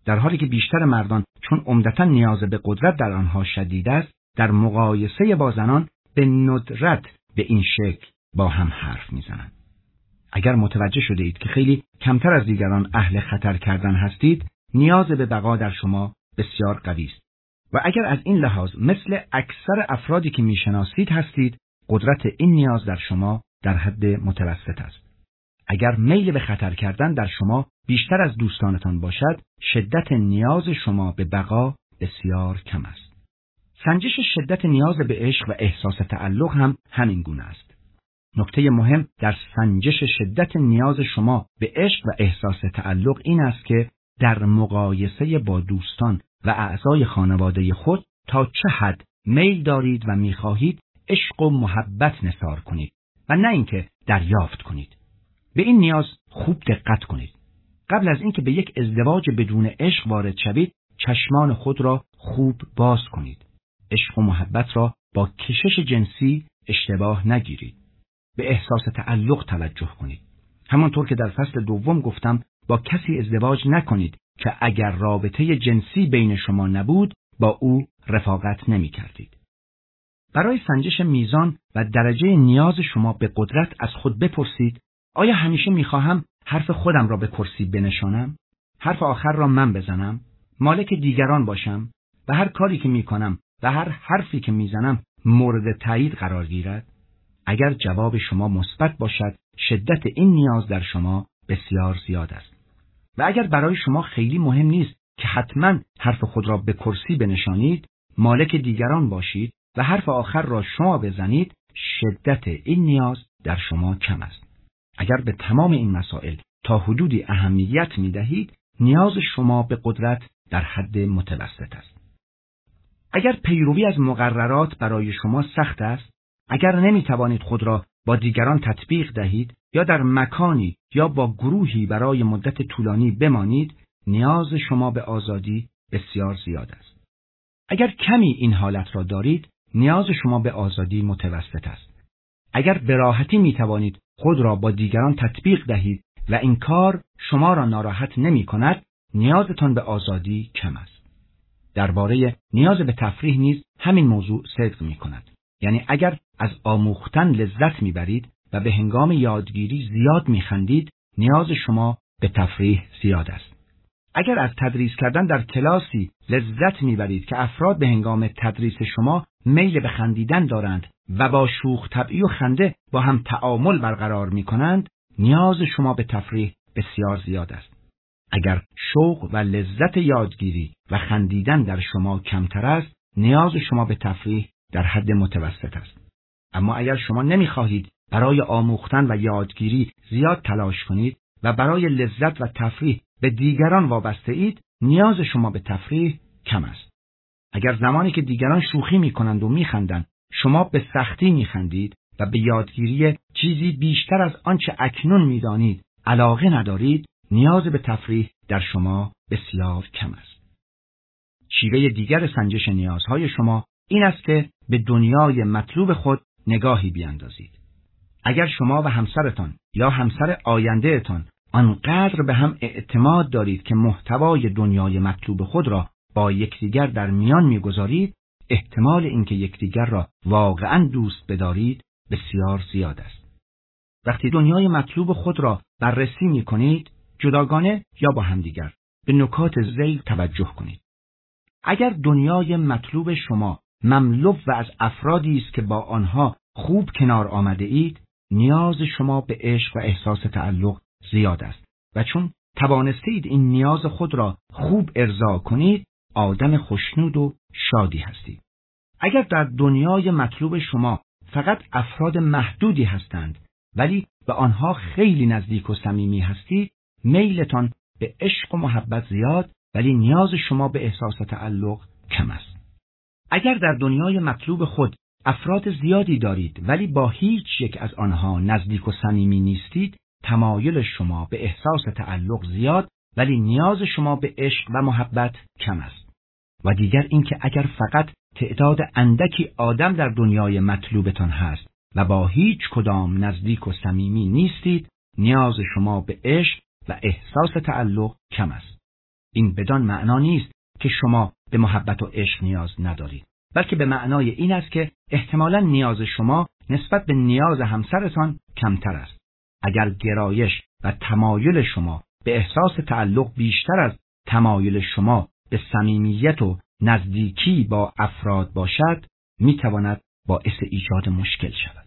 در حالی که بیشتر مردان چون عمدتاً نیاز به قدرت در آنها شدید است، در مقایسه با زنان به ندرت به این شکل با هم حرف میزنند. اگر متوجه شده اید که خیلی کمتر از دیگران اهل خطر کردن هستید، نیاز به بقا در شما بسیار قوی است. و اگر از این لحاظ مثل اکثر افرادی که میشناسید هستید، قدرت این نیاز در شما در حد متوسط است. اگر میل به خطر کردن در شما بیشتر از دوستانتان باشد، شدت نیاز شما به بقا بسیار کم است. سنجش شدت نیاز به عشق و احساس تعلق هم همین گونه است. نکته مهم در سنجش شدت نیاز شما به عشق و احساس تعلق این است که در مقایسه با دوستان و اعضای خانواده خود تا چه حد میل دارید و می‌خواهید عشق و محبت نثار کنید و نه اینکه دریافت کنید. به این نیاز خوب دقت کنید. قبل از اینکه به یک ازدواج بدون عشق وارد شوید، چشمان خود را خوب باز کنید. عشق و محبت را با کشش جنسی اشتباه نگیرید. به احساس تعلق توجه کنید. همانطور که در فصل دوم گفتم، با کسی ازدواج نکنید که اگر رابطه جنسی بین شما نبود، با او رفاقت نمی کردید. برای سنجش میزان و درجه نیاز شما به قدرت از خود بپرسید: آیا همیشه میخواهم حرف خودم را به کرسی بنشانم؟ حرف آخر را من بزنم؟ مالک دیگران باشم؟ و هر کاری که میکنم و هر حرفی که میزنم مورد تایید قرار گیرد؟ اگر جواب شما مثبت باشد، شدت این نیاز در شما بسیار زیاد است. و اگر برای شما خیلی مهم نیست که حتما حرف خود را به کرسی بنشانید، مالک دیگران باشید و حرف آخر را شما بزنید، شدت این نیاز در شما کم است. اگر به تمام این مسائل تا حدودی اهمیت می دهید، نیاز شما به قدرت در حد متوسط است. اگر پیروی از مقررات برای شما سخت است، اگر نمی توانید خود را با دیگران تطبیق دهید یا در مکانی یا با گروهی برای مدت طولانی بمانید، نیاز شما به آزادی بسیار زیاد است. اگر کمی این حالت را دارید، نیاز شما به آزادی متوسط است. اگر به راحتی می توانید خود را با دیگران تطبیق دهید و این کار شما را ناراحت نمی کند، نیازتان به آزادی کم است. درباره نیاز به تفریح نیز همین موضوع صدق می کند. یعنی اگر از آموختن لذت می برید و به هنگام یادگیری زیاد می خندید، نیاز شما به تفریح زیاد است. اگر از تدریس کردن در کلاسی لذت می برید که افراد به هنگام تدریس شما میل به خندیدن دارند و با شوخ طبعی و خنده با هم تعامل برقرار می کنند، نیاز شما به تفریح بسیار زیاد است. اگر شوق و لذت یادگیری و خندیدن در شما کمتر است، نیاز شما به تفریح در حد متوسط است. اما اگر شما نمی‌خواهید برای آموختن و یادگیری زیاد تلاش کنید و برای لذت و تفریح به دیگران وابسته اید، نیاز شما به تفریح کم است. اگر زمانی که دیگران شوخی می‌کنند و می‌خندند، شما به سختی می‌خندید و به یادگیری چیزی بیشتر از آنچه اکنون می‌دانید علاقه ندارید، نیاز به تفریح در شما بسیار کم است. شیوه دیگر سنجش نیازهای شما این است که به دنیای مطلوب خود نگاهی بیاندازید. اگر شما و همسرتان یا همسر آیندهتان آنقدر به هم اعتماد دارید که محتوای دنیای مطلوب خود را با یکدیگر در میان میگذارید، احتمال اینکه یکدیگر را واقعاً دوست بدارید بسیار زیاد است. وقتی دنیای مطلوب خود را بررسی میکنید، جداگانه یا با همدیگر، به نکات ذیل توجه کنید. اگر دنیای مطلوب شما مملو و از افرادی است که با آنها خوب کنار آمده اید، نیاز شما به عشق و احساس تعلق زیاد است و چون توانستید این نیاز خود را خوب ارضا کنید، آدم خوشنود و شادی هستید. اگر در دنیای مطلوب شما فقط افراد محدودی هستند ولی به آنها خیلی نزدیک و صمیمی هستید، میلتان به عشق و محبت زیاد ولی نیاز شما به احساس تعلق کم است. اگر در دنیای مطلوب خود افراد زیادی دارید ولی با هیچ یک از آنها نزدیک و صمیمی نیستید، تمایل شما به احساس تعلق زیاد ولی نیاز شما به عشق و محبت کم است. و دیگر اینکه اگر فقط تعداد اندکی آدم در دنیای مطلوبتان هست و با هیچ کدام نزدیک و صمیمی نیستید، نیاز شما به عشق و احساس تعلق کم است. این بدان معنا نیست که شما به محبت و عشق نیاز ندارید، بلکه به معنای این است که احتمالاً نیاز شما نسبت به نیاز همسرتان کمتر است. اگر گرایش و تمایل شما به احساس تعلق بیشتر از تمایل شما به صمیمیت و نزدیکی با افراد باشد، میتواند باعث ایجاد مشکل شود.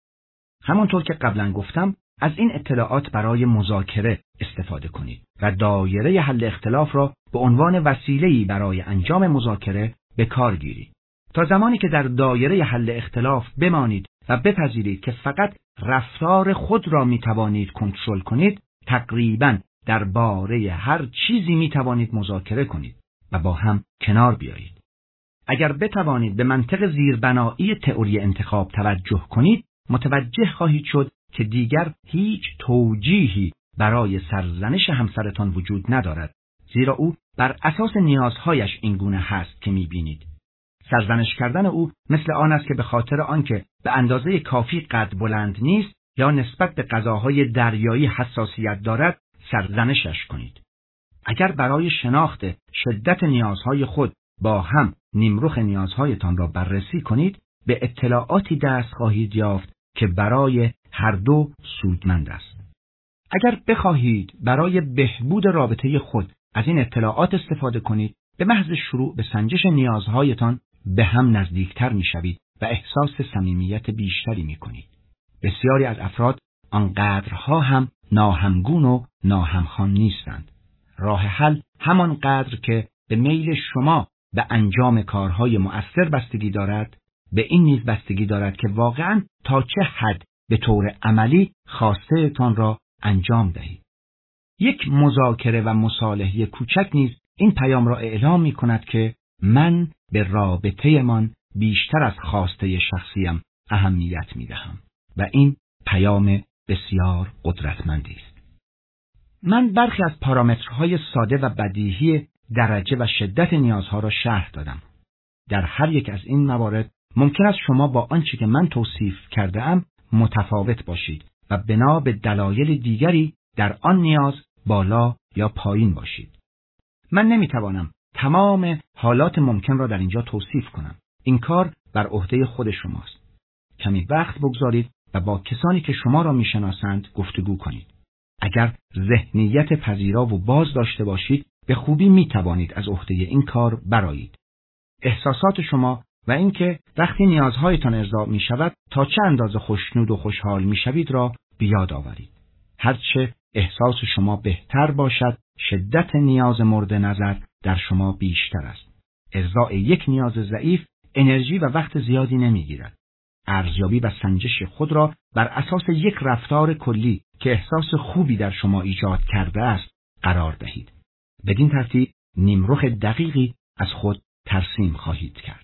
همانطور که قبلا گفتم، از این اطلاعات برای مذاکره استفاده کنید و دایره حل اختلاف را به عنوان وسیله‌ای برای انجام مذاکره به کار گیرید. تا زمانی که در دایره حل اختلاف بمانید و بپذیرید که فقط رفتار خود را می توانید کنترل کنید، تقریباً درباره هر چیزی می توانید مذاکره کنید و با هم کنار بیایید. اگر بتوانید به منطق زیربنایی تئوری انتخاب توجه کنید، متوجه خواهید شد که دیگر هیچ توجیهی برای سرزنش همسرتان وجود ندارد، زیرا او بر اساس نیازهایش این گونه هست که می بینید. سرزنش کردن او مثل آن است که به خاطر آنکه به اندازه کافی قد بلند نیست یا نسبت به غذاهای دریایی حساسیت دارد سرزنشش کنید. اگر برای شناخت شدت نیازهای خود با هم نیمرخ نیازهایتان را بررسی کنید، به اطلاعاتی دست خواهید یافت که برای هر دو سودمند است. اگر بخواهید برای بهبود رابطه خود از این اطلاعات استفاده کنید، به محض شروع به سنجش نیازهایتان به هم نزدیکتر می‌شوید و احساس صمیمیت بیشتری می‌کنید. بسیاری از افراد آنقدرها هم ناهمگون و ناهمخوان نیستند. راه حل همانقدر که به میل شما به انجام کارهای مؤثر بستگی دارد، به این نیز بستگی دارد که واقعاً تا چه حد به طور عملی خواسته‌تان را انجام دهید. یک مذاکره و مصالحه کوچک نیز این پیام را اعلام می کند که من به رابطه من بیشتر از خواسته شخصیم اهمیت می دهم و این پیام بسیار قدرتمندی است. من برخی از پارامترهای ساده و بدیهی درجه و شدت نیازها را شرح دادم. در هر یک از این موارد ممکن است شما با آنچه که من توصیف کرده ام متفاوت باشید و بنا به دلایل دیگری در آن نیاز بالا یا پایین باشید. من نمیتوانم تمام حالات ممکن را در اینجا توصیف کنم. این کار بر عهده خود شماست. کمی وقت بگذارید و با کسانی که شما را میشناسند گفتگو کنید. اگر ذهنیت پذیرا و باز داشته باشید، به خوبی میتوانید از عهده این کار برآیید. احساسات شما و اینکه وقتی نیازهایتان ارضا می شود تا چه اندازه خوشنود و خوشحال می شوید را بیاد آورید. هرچه احساس شما بهتر باشد، شدت نیاز مورد نظر در شما بیشتر است. ارضاء یک نیاز ضعیف انرژی و وقت زیادی نمی گیرد. ارزیابی و سنجش خود را بر اساس یک رفتار کلی که احساس خوبی در شما ایجاد کرده است قرار دهید. بدین ترتیب نیمرخ دقیقی از خود ترسیم خواهید کرد.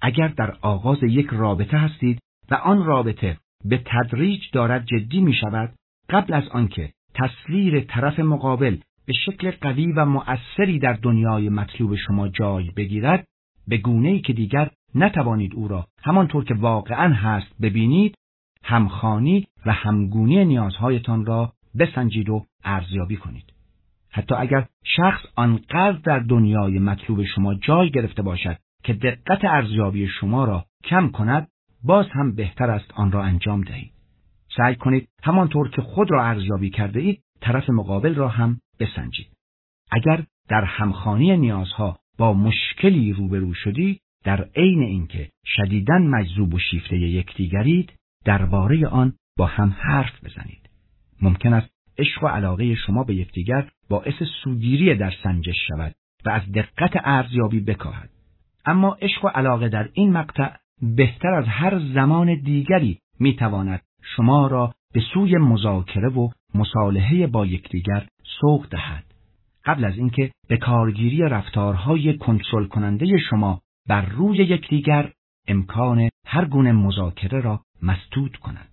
اگر در آغاز یک رابطه هستید و آن رابطه به تدریج دارد جدی می شود، قبل از آنکه تصویر طرف مقابل به شکل قوی و مؤثری در دنیای مطلوب شما جای بگیرد، به گونه‌ای که دیگر نتوانید او را همانطور که واقعاً هست ببینید، همخوانی و همگونی نیازهایتان را بسنجید و ارزیابی کنید. حتی اگر شخص آنقدر در دنیای مطلوب شما جای گرفته باشد که دقت ارزیابی شما را کم کند، باز هم بهتر است آن را انجام دهید. سعی کنید همانطور که خود را ارزیابی کرده اید، طرف مقابل را هم بسنجید. اگر در همخوانی نیازها با مشکلی روبرو شدید، در عین اینکه شدیداً مجذوب و شیفته یکدیگرید، درباره آن با هم حرف بزنید. ممکن است عشق و علاقه شما به یکدیگر باعث سوگیری در سنجش شود و از دقت ارزیابی بکاهد. اما عشق و علاقه در این مقطع بهتر از هر زمان دیگری میتواند شما را به سوی مذاکره و مصالحه با یکدیگر سوق دهد، قبل از اینکه به کارگیری رفتارهای کنترل کننده شما بر روی یکدیگر امکان هر گونه مذاکره را مسدود کند.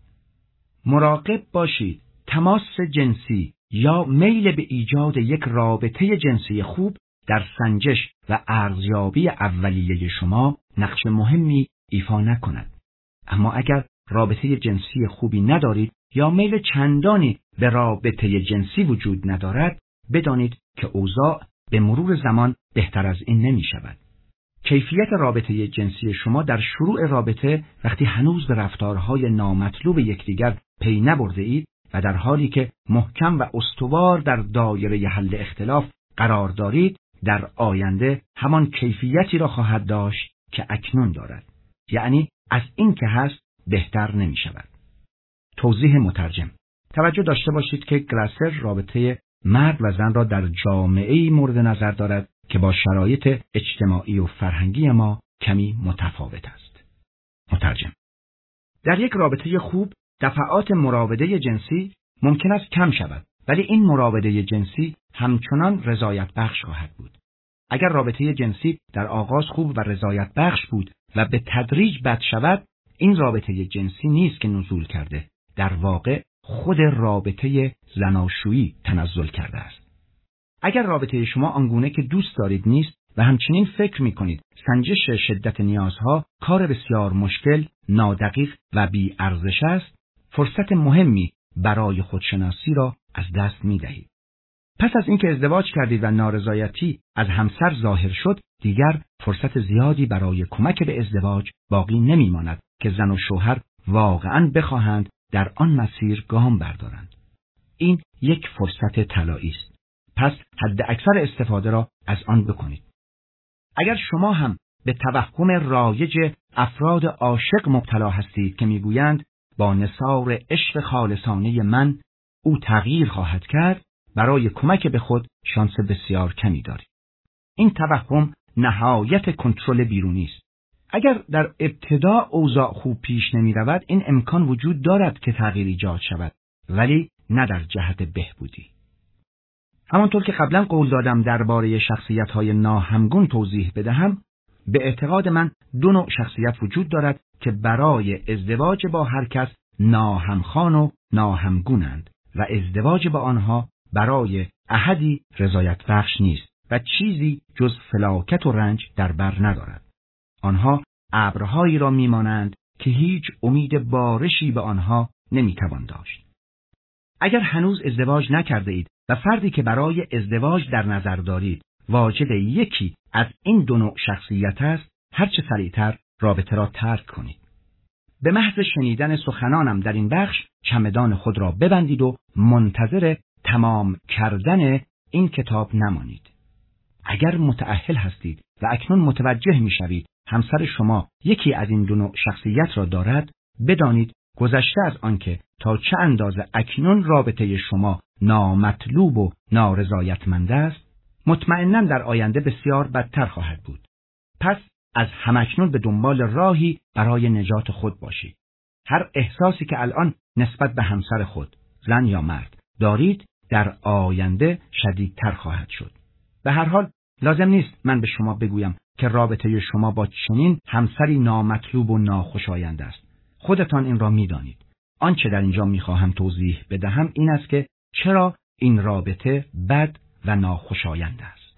مراقب باشید تماس جنسی یا میل به ایجاد یک رابطه جنسی خوب در سنجش و ارزیابی اولیه شما نقش مهمی ایفا نکند. اما اگر رابطه جنسی خوبی ندارید یا میل چندانی به رابطه جنسی وجود ندارد، بدانید که اوضاع به مرور زمان بهتر از این نمی شود. کیفیت رابطه جنسی شما در شروع رابطه، وقتی هنوز به رفتارهای نامطلوب یکدیگر پی نبرده اید و در حالی که محکم و استوار در دایره حل اختلاف قرار دارید، در آینده همان کیفیتی را خواهد داشت که اکنون دارد. یعنی از این که هست بهتر نمی شود. توضیح مترجم: توجه داشته باشید که گلاسر رابطه مرد و زن را در جامعه‌ای مورد نظر دارد که با شرایط اجتماعی و فرهنگی ما کمی متفاوت است. مترجم: در یک رابطه خوب دفعات مراوده جنسی ممکن است کم شود، ولی این مراوده جنسی همچنان رضایت بخش خواهد بود. اگر رابطه جنسی در آغاز خوب و رضایت بخش بود و به تدریج بد شود، این رابطه جنسی نیست که نزول کرده، در واقع خود رابطه زناشویی تنزل کرده است. اگر رابطه شما آنگونه که دوست دارید نیست و همچنین فکر می کنید سنجش شدت نیازها کار بسیار مشکل، نادقیق و بی ارزش است، فرصت مهمی برای خودشناسی را از دست می دهید. پس از اینکه ازدواج کردید و نارضایتی از همسر ظاهر شد، دیگر فرصت زیادی برای کمک به ازدواج باقی نمی ماند که زن و شوهر واقعاً بخواهند در آن مسیر گام بردارند. این یک فرصت طلایی است. پس حد اکثر استفاده را از آن بکنید. اگر شما هم به توهم رایج افراد عاشق مبتلا هستید که میگویند با نثار عشق خالصانه من او تغییر خواهد کرد، برای کمک به خود شانس بسیار کمی دارید. این توهم نهایت کنترل بیرونی است. اگر در ابتدا اوضاع خوب پیش نمی رود، این امکان وجود دارد که تغییر ایجاد شود، ولی نه در جهت بهبودی. همانطور که قبلا قول دادم درباره شخصیت‌های ناهمگون توضیح بدهم، به اعتقاد من دو نوع شخصیت وجود دارد که برای ازدواج با هر کس ناهمخوان و ناهمگونند و ازدواج با آنها برای احدی رضایت بخش نیست و چیزی جز فلاکت و رنج در بر ندارد. آنها ابرهایی را میمانند که هیچ امید بارشی به آنها نمیتوان داشت. اگر هنوز ازدواج نکرده اید و فردی که برای ازدواج در نظر دارید واجد یکی از این دو نوع شخصیت است، هرچه سریعتر رابطه را ترک کنید. به محض شنیدن سخنانم در این بخش چمدان خود را ببندید و منتظر تمام کردن این کتاب نمانید. اگر متأهل هستید و اکنون متوجه می‌شوید همسر شما یکی از این دو نوع شخصیت را دارد، بدانید گذشته از آنکه تا چه اندازه اکنون رابطه شما نامطلوب و نارضایتمند است، مطمئناً در آینده بسیار بدتر خواهد بود. پس از همکنون به دنبال راهی برای نجات خود باشید. هر احساسی که الان نسبت به همسر خود، زن یا مرد، دارید در آینده شدیدتر خواهد شد. به هر حال لازم نیست من به شما بگویم که رابطه شما با چنین همسری نامطلوب و ناخوشایند است. خودتان این را می‌دانید. آنچه در اینجا می‌خواهم توضیح بدهم این است که چرا این رابطه بد و ناخوشایند است.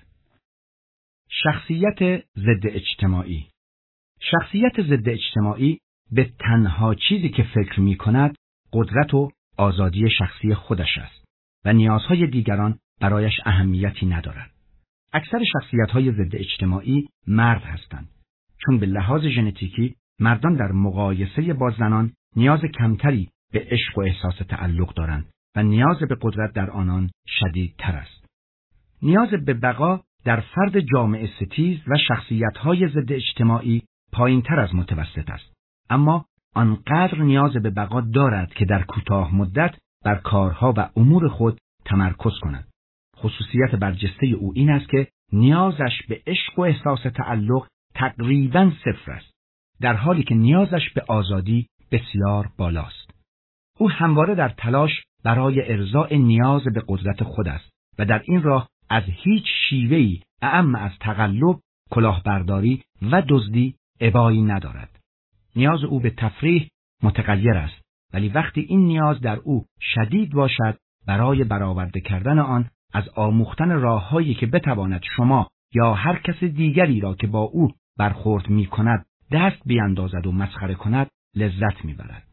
شخصیت ضد اجتماعی. شخصیت ضد اجتماعی به تنها چیزی که فکر می‌کند قدرت و آزادی شخصی خودش است و نیازهای دیگران برایش اهمیتی ندارد. اکثر شخصیت‌های ضد اجتماعی مرد هستند، چون به لحاظ ژنتیکی مردان در مقایسه با زنان نیاز کمتری به عشق و احساس تعلق دارند و نیاز به قدرت در آنان شدیدتر است. نیاز به بقا در فرد جامعه ستیز و شخصیت‌های ضد اجتماعی پایین‌تر از متوسط است، اما آنقدر نیاز به بقا دارد که در کوتاه مدت بر کارها و امور خود تمرکز کند. خصوصیت برجسته او این است که نیازش به عشق و احساس تعلق تقریباً صفر است، در حالی که نیازش به آزادی بسیار بالاست. او همواره در تلاش برای ارضاء نیاز به قدرت خود است و در این راه از هیچ شیوه‌ای اعم از تقلب، کلاهبرداری و دزدی ابایی ندارد. نیاز او به تفریح متغیر است، ولی وقتی این نیاز در او شدید باشد، برای برآورده کردن آن از آموختن راه‌هایی که بتواند شما یا هر کس دیگری را که با او برخورد می‌کند دست بیاندازد و مسخره کند لذت می‌برد.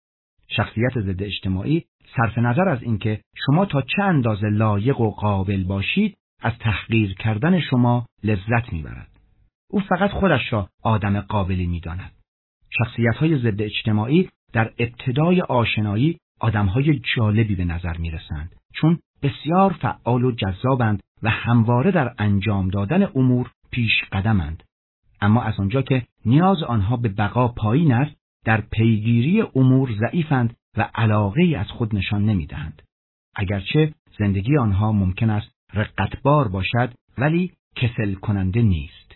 شخصیت ضد اجتماعی صرف نظر از اینکه شما تا چه اندازه لایق و قابل باشید از تحقیر کردن شما لذت می‌برد. او فقط خودش را آدم قابلی می‌داند. شخصیت‌های ضد اجتماعی در ابتدای آشنایی آدم‌های جالبی به نظر می‌رسند، چون بسیار فعال و جذابند و همواره در انجام دادن امور پیش قدمند. اما از آنجا که نیاز آنها به بقا پایین است، در پیگیری امور ضعیفند و علاقه‌ای از خود نشان نمی‌دهند. اگرچه زندگی آنها ممکن است رقتبار باشد، ولی کسل کننده نیست.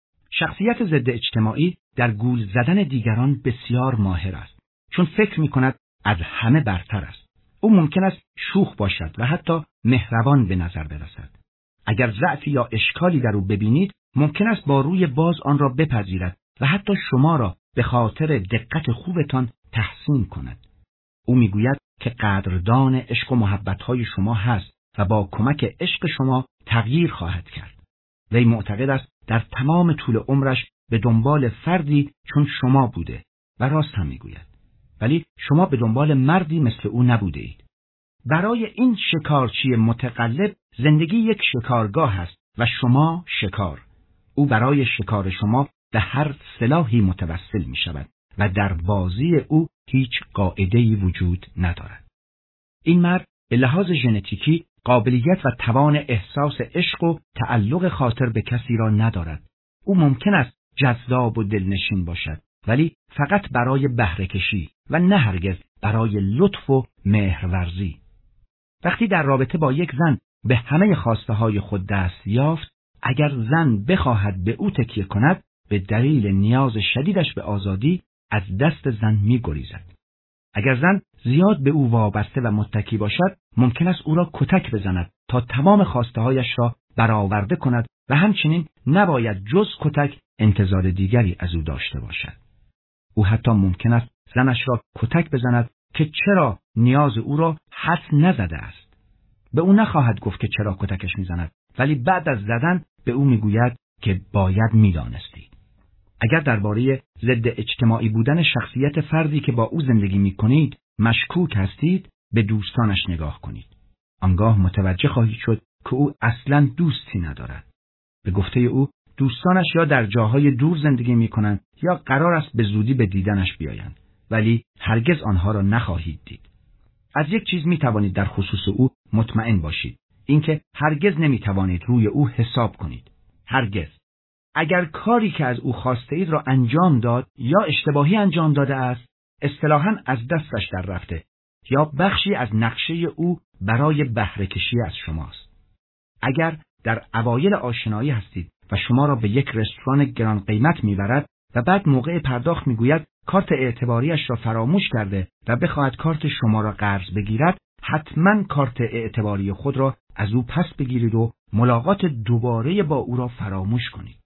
شخصیت ضد اجتماعی در گول زدن دیگران بسیار ماهر است، چون فکر می‌کند از همه برتر است. او ممکن است شوخ باشد و حتی مهربان به نظر برسد. اگر ضعفی یا اشکالی در او ببینید، ممکن است با روی باز آن را بپذیرد و حتی شما را به خاطر دقت خوبتان تحسین کند. او میگوید که قدردان عشق و محبت‌های شما هست و با کمک عشق شما تغییر خواهد کرد. وی معتقد است در تمام طول عمرش به دنبال فردی چون شما بوده و راست هم میگوید. ولی شما به دنبال مردی مثل او نبوده اید. برای این شکارچی متقلب زندگی یک شکارگاه است و شما شکار. او برای شکار شما به هر سلاحی متوسل می شود و در بازی او هیچ قاعده‌ای وجود ندارد. این مرد به لحاظ ژنتیکی قابلیت و توان احساس عشق و تعلق خاطر به کسی را ندارد. او ممکن است جذاب و دلنشین باشد، ولی فقط برای بهره کشی و نه هرگز برای لطف و مهرورزی. وقتی در رابطه با یک زن به همه خواسته های خود دست یافت، اگر زن بخواهد به او تکیه کند، به دلیل نیاز شدیدش به آزادی از دست زن می گریزد. اگر زن زیاد به او وابسته و متکی باشد، ممکن است او را کتک بزند تا تمام خواسته هایش را برآورده کند و همچنین نباید جز کتک انتظار دیگری از او داشته باشد. او حتی ممکن است زنش را کتک بزند که چرا نیاز او را حدس نزده است. به او نخواهد گفت که چرا کتکش میزند، ولی بعد از زدن به او میگوید که باید میدانستی. اگر درباره ضد اجتماعی بودن شخصیت فردی که با او زندگی میکنید مشکوک هستید، به دوستانش نگاه کنید. آنگاه متوجه خواهید شد که او اصلاً دوستی ندارد. به گفته او دوستانش یا در جاهای دور زندگی میکنند یا قرار است به زودی به دیدنش بیایند، ولی هرگز آنها را نخواهید دید. از یک چیز میتوانید در خصوص او مطمئن باشید، اینکه هرگز نمیتوانید روی او حساب کنید. هرگز. اگر کاری که از او خواسته اید را انجام داد یا اشتباهی انجام داده است، اصطلاحاً از دستش در رفته یا بخشی از نقشه او برای بهره کشی از شماست. اگر در اوایل آشنایی هستید و شما را به یک رستوران گران قیمت میبرد و بعد موقع پرداخت میگوید کارت اعتباریش را فراموش کرده و بخواهد کارت شما را قرض بگیرد، حتما کارت اعتباری خود را از او پس بگیرید و ملاقات دوباره با او را فراموش کنید.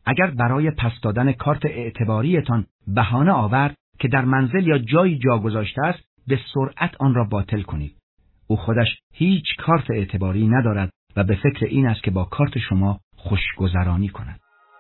اگر برای پس دادن کارت اعتباریتان بهانه آورد که در منزل یا جایی جا گذاشته است، به سرعت آن را باطل کنید. او خودش هیچ کارت اعتباری ندارد و به فکر این است که با کارت شما خوشگذرانی کند.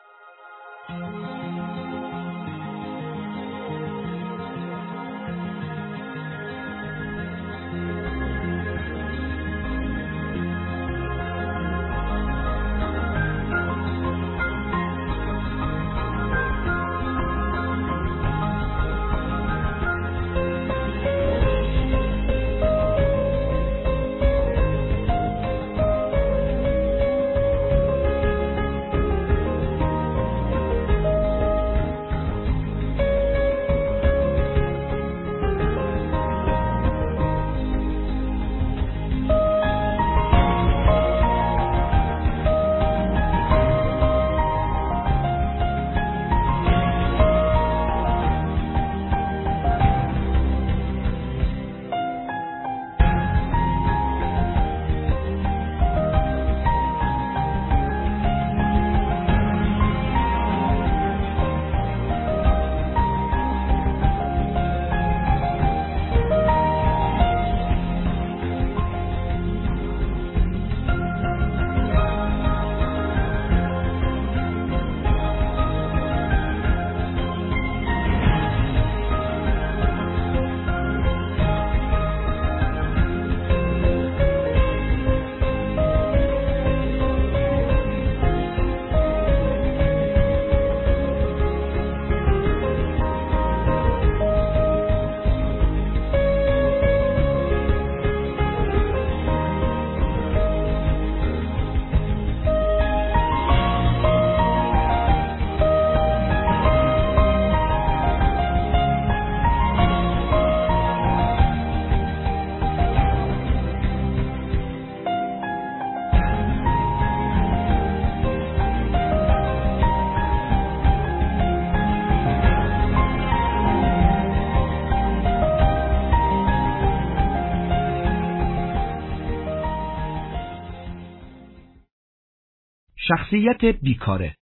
شخصیت بیکاره.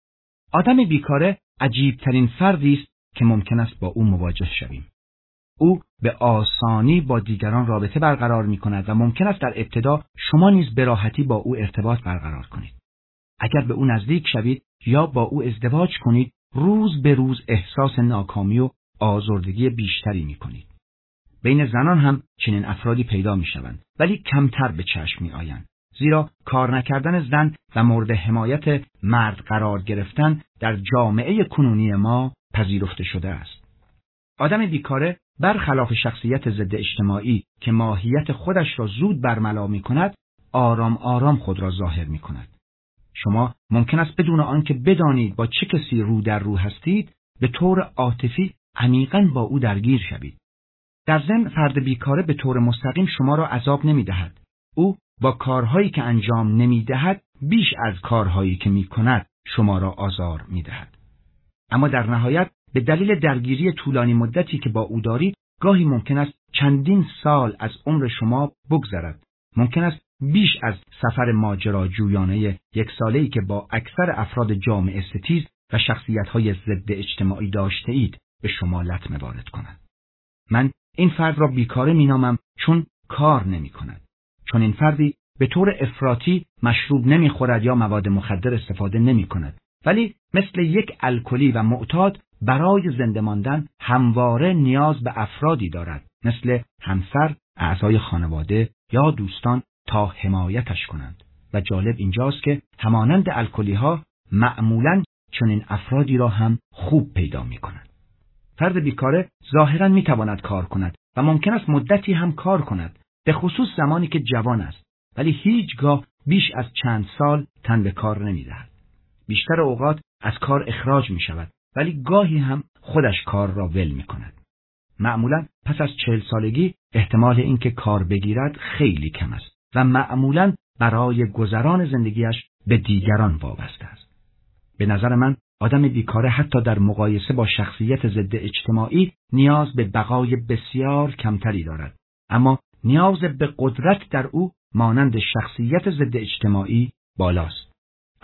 آدم بیکاره عجیبترین فردی است که ممکن است با او مواجه شویم. او به آسانی با دیگران رابطه برقرار می کند و ممکن است در ابتدا شما نیز به راحتی با او ارتباط برقرار کنید. اگر به او نزدیک شوید یا با او ازدواج کنید، روز به روز احساس ناکامی و آزردگی بیشتری می کنید. بین زنان هم چنین افرادی پیدا می شوند، ولی کمتر به چشم می آیند. زیرا کار نکردن زن و مورد حمایت مرد قرار گرفتن در جامعه کنونی ما پذیرفته شده است. آدم بیکاره برخلاف شخصیت ضد اجتماعی که ماهیت خودش را زود برملا می کند، آرام آرام خود را ظاهر می کند. شما ممکن است بدون آنکه بدانید با چه کسی رو در رو هستید، به طور عاطفی عمیقاً با او درگیر شوید. در ضمن فرد بیکاره به طور مستقیم شما را عذاب نمی دهد. او با کارهایی که انجام نمی دهد بیش از کارهایی که می کند شما را آزار می دهد. اما در نهایت به دلیل درگیری طولانی مدتی که با او دارید، گاهی ممکن است چندین سال از عمر شما بگذرد. ممکن است بیش از سفر ماجراجویانه یک ساله‌ای که با اکثر افراد جامعه ستیز و شخصیت‌های ضد اجتماعی داشته اید به شما لطمه وارد کند. من این فرد را بیکاره می‌نامم چون کار نمی‌کند. چون این فردی به طور افراطی مشروب نمی‌خورد یا مواد مخدر استفاده نمی‌کند، ولی مثل یک الکلی و معتاد برای زنده ماندن همواره نیاز به افرادی دارد، مثل همسر، اعضای خانواده یا دوستان تا حمایتش کنند. و جالب اینجاست که همانند الکلی‌ها معمولاً چنین افرادی را هم خوب پیدا می‌کنند. فرد بیکاره ظاهراً می‌تواند کار کند و ممکن است مدتی هم کار کند، به خصوص زمانی که جوان است، ولی هیچگاه بیش از چند سال تن به کار نمی‌دهد. بیشتر اوقات از کار اخراج می‌شود، ولی گاهی هم خودش کار را ول می‌کند. معمولاً پس از چهل سالگی احتمال اینکه کار بگیرد خیلی کم است و معمولاً برای گذران زندگیش به دیگران وابسته است. به نظر من آدم بیکاره حتی در مقایسه با شخصیت ضد اجتماعی نیاز به بقای بسیار کمتری دارد، اما نیاز به قدرت در او مانند شخصیت ضد اجتماعی بالاست.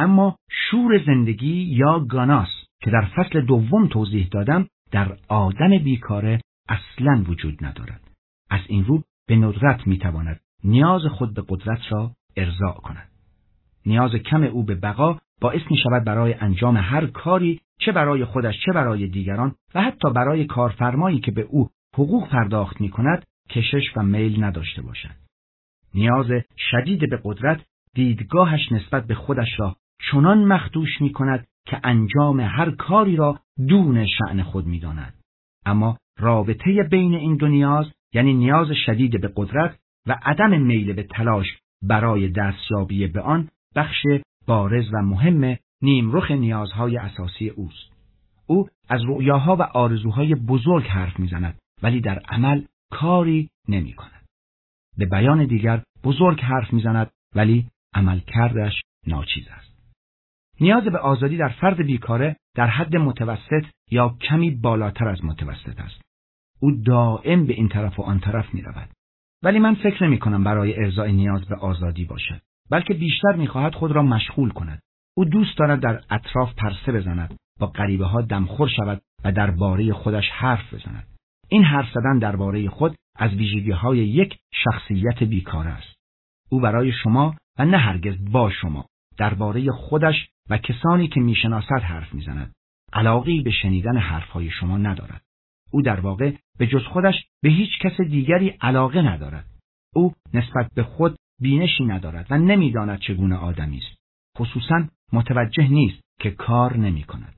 اما شور زندگی یا گاناس که در فصل دوم توضیح دادم در آدم بیکاره اصلاً وجود ندارد. از این رو به ندرت میتواند نیاز خود به قدرت را ارضاء کند. نیاز کم او به بقا باعث می شود برای انجام هر کاری، چه برای خودش چه برای دیگران و حتی برای کارفرمایی که به او حقوق پرداخت می کند، کشش و میل نداشته باشد. نیاز شدید به قدرت دیدگاهش نسبت به خودش را چنان مخدوش می کند که انجام هر کاری را دون شأن خود می داند. اما رابطه بین این دو نیاز، یعنی نیاز شدید به قدرت و عدم میل به تلاش برای دستیابی به آن، بخش بارز و مهم نیمرخ نیازهای اساسی اوست. او از رؤیاها و آرزوهای بزرگ حرف میزند ولی در عمل کاری نمی کند. به بیان دیگر بزرگ حرف میزند ولی عمل کردش ناچیز است. نیاز به آزادی در فرد بیکاره در حد متوسط یا کمی بالاتر از متوسط است. او دائم به این طرف و آن طرف می رود. ولی من فکر نمی کنم برای ارضای نیاز به آزادی باشد، بلکه بیشتر می خواهد خود را مشغول کند. او دوست دارد در اطراف پرسه بزند، با غریبه ها دمخور شود و درباره خودش حرف بزند. این حرف زدن درباره خود از ویژگی‌های یک شخصیت بیکاره است. او برای شما و نه هرگز با شما درباره خودش و کسانی که میشناسد حرف میزند. علاقه‌ای به شنیدن حرفهای شما ندارد. او در واقع به جز خودش به هیچ کس دیگری علاقه ندارد. او نسبت به خود بینشی ندارد و نمیداند چگونه آدمی است. خصوصاً متوجه نیست که کار نمی کند.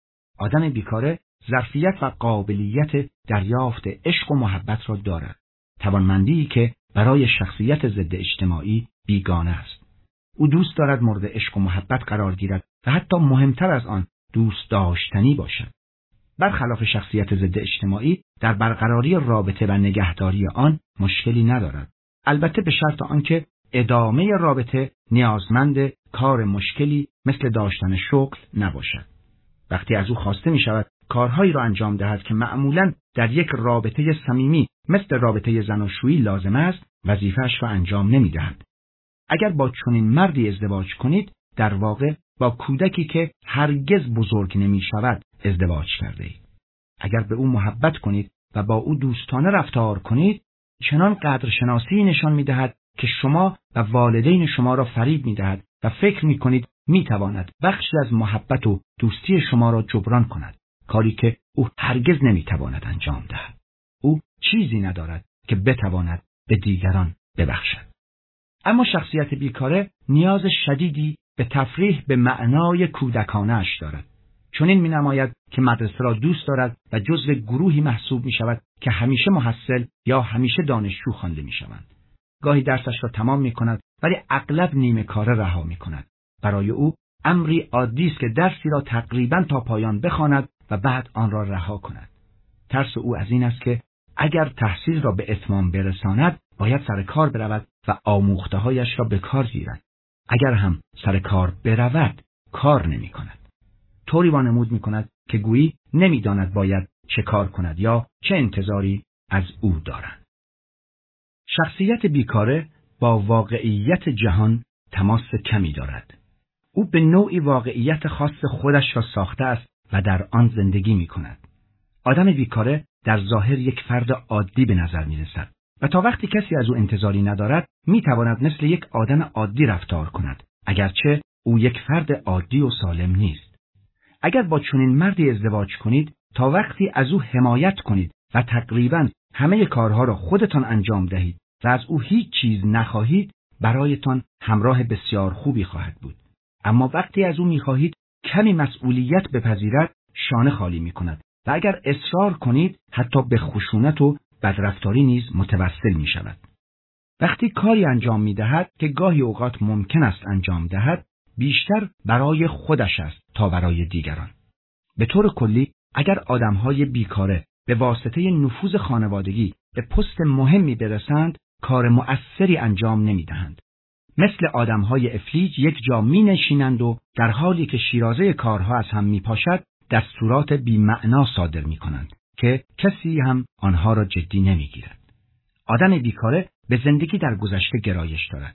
آدم بیکاره ظرفیت و قابلیت دریافت عشق و محبت را دارد. توانمندی که برای شخصیت ضد اجتماعی بیگانه است. او دوست دارد مورد عشق و محبت قرار گیرد و حتی مهمتر از آن دوست داشتنی باشد. برخلاف شخصیت ضد اجتماعی در برقراری رابطه و نگهداری آن مشکلی ندارد. البته به شرط آنکه ادامه رابطه نیازمند کار مشکلی مثل داشتن شغل نباشد. وقتی از او خواسته می شود کارهایی را انجام دهد که معمولاً در یک رابطه صمیمی مثل رابطه زناشویی لازم است، وظیفه‌اش را انجام نمی دهد. اگر با چنین مردی ازدواج کنید، در واقع با کودکی که هرگز بزرگ نمی شود ازدواج کرده اید. اگر به او محبت کنید و با او دوستانه رفتار کنید، چنان قدرشناسی نشان می دهد که شما و والدین شما را فریب می دهد و فکر می کنید می تواند بخشی از محبت و دوستی شما را جبران کند، کاری که او هرگز نمی تواند انجام دهد. او چیزی ندارد که بتواند به دیگران ببخشد. اما شخصیت بیکاره نیاز شدیدی به تفریح به معنای کودکانه‌اش دارد. چون این می نماید که مدرسه را دوست دارد و جزو گروهی محسوب می شود که همیشه محصل یا همیشه دانشجو خوانده می شوند. گاهی درسش را تمام می کند ولی اغلب نیمه کاره رها می کند. برای او امری عادی است که درسی را تقریباً تا پایان بخواند و بعد آن را رها کند. ترس او از این است که اگر تحصیل را به اتمام برساند باید سر کار برود و آموخته‌هایش را به کار گیرد. اگر هم سر کار برود کار نمی کند. طوری وانمود می کند که گویی نمی داند باید چه کار کند یا چه انتظاری از او دارند. شخصیت بیکاره با واقعیت جهان تماس کمی دارد. او به نوعی واقعیت خاص خودش را ساخته است و در آن زندگی می کند. آدم بیکاره در ظاهر یک فرد عادی به نظر می رسد و تا وقتی کسی از او انتظاری ندارد می تواند مثل یک آدم عادی رفتار کند، اگرچه او یک فرد عادی و سالم نیست. اگر با چنین مردی ازدواج کنید، تا وقتی از او حمایت کنید و تقریباً همه کارها را خودتان انجام دهید و از او هیچ چیز نخواهید، برایتان همراه بسیار خوبی خواهد بود. اما وقتی از او می‌خواهید کمی مسئولیت بپذیرد، شانه خالی می‌کند و اگر اصرار کنید حتی به خشونت و بدرفتاری نیز متوسل می‌شود. وقتی کاری انجام می‌دهد که گاهی اوقات ممکن است انجام دهد، بیشتر برای خودش است تا برای دیگران. به طور کلی اگر آدم‌های بیکاره به واسطه نفوذ خانوادگی به پست مهمی برسند، کار مؤثری انجام نمی‌دهند. مثل آدم‌های افلیج یک جا می‌نشینند و در حالی که شیرازه کارها از هم می‌پاشد، دستورات بی‌معنا صادر می‌کنند که کسی هم آنها را جدی نمی‌گیرد. آدم بیکاره به زندگی در گذشته گرایش دارد.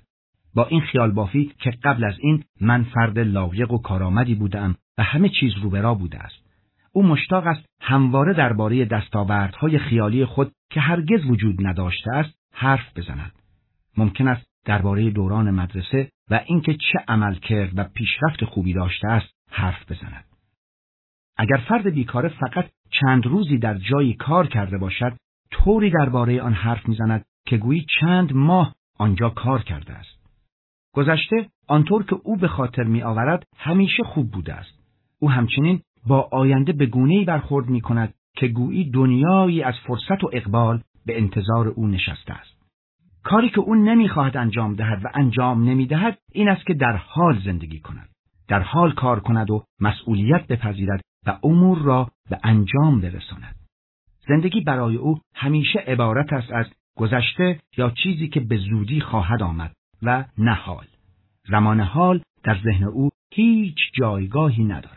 با این خیال بافی که قبل از این من فرد لایق و کارآمدی بودم و همه چیز رو به راه بوده است. او مشتاق است همواره درباره دستاوردهای خیالی خود که هرگز وجود نداشته است حرف بزند. ممکن است درباره دوران مدرسه و اینکه چه عمل کرد و پیشرفت خوبی داشته است حرف بزند. اگر فرد بیکاره فقط چند روزی در جایی کار کرده باشد، طوری درباره آن حرف میزند که گویی چند ماه آنجا کار کرده است. گذشته آنطور که او به خاطر می آورد همیشه خوب بوده است. او همچنین با آینده به گونه‌ای برخورد می کند که گویی دنیایی از فرصت و اقبال به انتظار او نشسته است. کاری که او نمی‌خواهد انجام دهد و انجام نمی‌دهد این است که در حال زندگی کند، در حال کار کند و مسئولیت بپذیرد و امور را به انجام برساند. زندگی برای او همیشه عبارت است از گذشته یا چیزی که به زودی خواهد آمد و نه حال. زمان حال در ذهن او هیچ جایگاهی ندارد.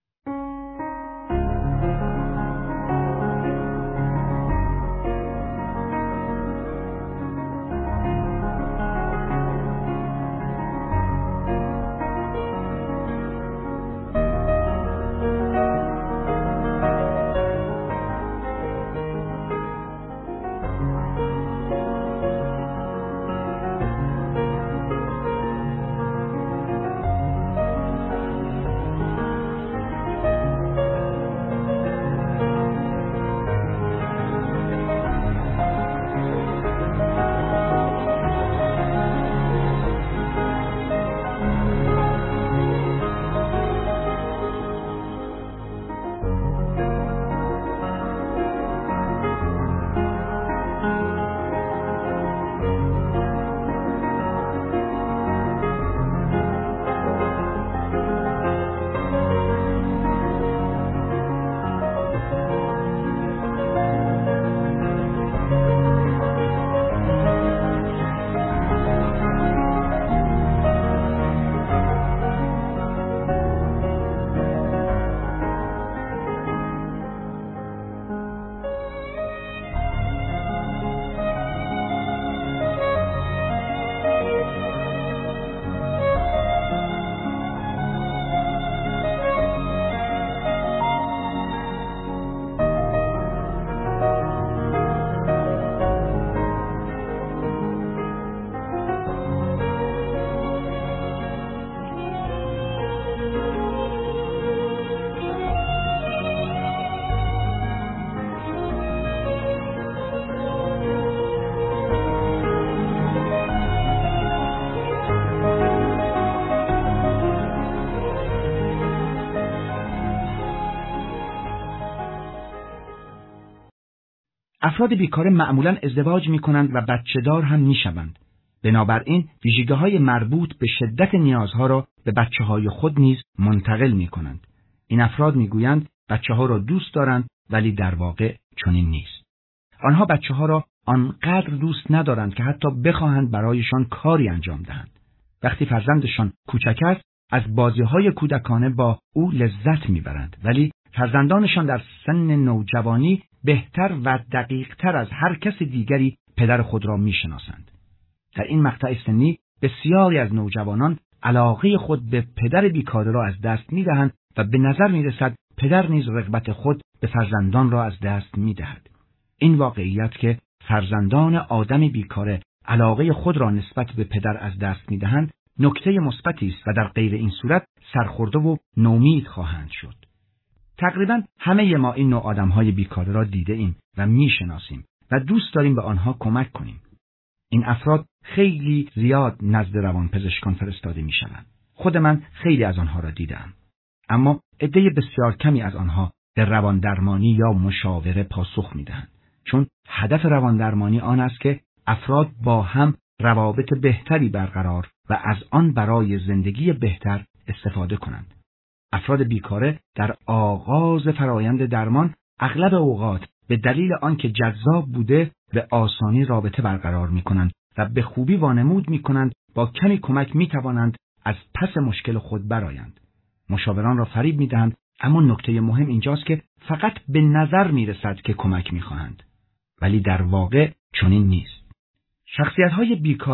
افراد بیکاره معمولاً ازدواج می‌کنند و بچه‌دار هم می‌شوند. بنابراین ویژگی‌های مربوط به شدت نیازها را به بچه‌های خود نیز منتقل می‌کنند. این افراد می‌گویند بچه‌ها را دوست دارند ولی در واقع چنین نیست. آنها بچه‌ها را آنقدر دوست ندارند که حتی بخواهند برایشان کاری انجام دهند. وقتی فرزندشان کوچک است از بازی‌های کودکانه با او لذت می‌برند، ولی فرزندانشان در سن نوجوانی بهتر و دقیق‌تر از هر کس دیگری پدر خود را می‌شناسند. در این مقطع سنی بسیاری از نوجوانان علاقه خود به پدر بیکاره را از دست می‌دهند و به نظر می‌رسد پدر نیز رغبت خود به فرزندان را از دست می‌دهد. این واقعیت که فرزندان آدم بیکاره علاقه خود را نسبت به پدر از دست می‌دهند، نکته مثبتی است و در غیر این صورت سرخورده و نومید خواهند شد. تقریباً همه ما این نوع آدم‌های بیکاره را دیده ایم و می‌شناسیم و دوست داریم به آنها کمک کنیم. این افراد خیلی زیاد نزد روانپزشکان فرستاده می‌شوند. خود من خیلی از آنها را دیدم. اما عده بسیار کمی از آنها به رواندرمانی یا مشاوره پاسخ می‌دهند، چون هدف رواندرمانی آن است که افراد با هم روابط بهتری برقرار و از آن برای زندگی بهتر استفاده کنند. افراد بیکاره در آغاز فرایند درمان اغلب اوقات به دلیل آنکه جذاب بوده به آسانی رابطه برقرار می‌کنند و به خوبی وانمود می‌کنند با کمی کمک می‌توانند از پس مشکل خود برآیند. مشاوران را فریب می‌دهند، اما نکته مهم اینجاست که فقط به نظر می‌رسد که کمک می‌خواهند، ولی در واقع چنین نیست. شخصیت‌های بیکاره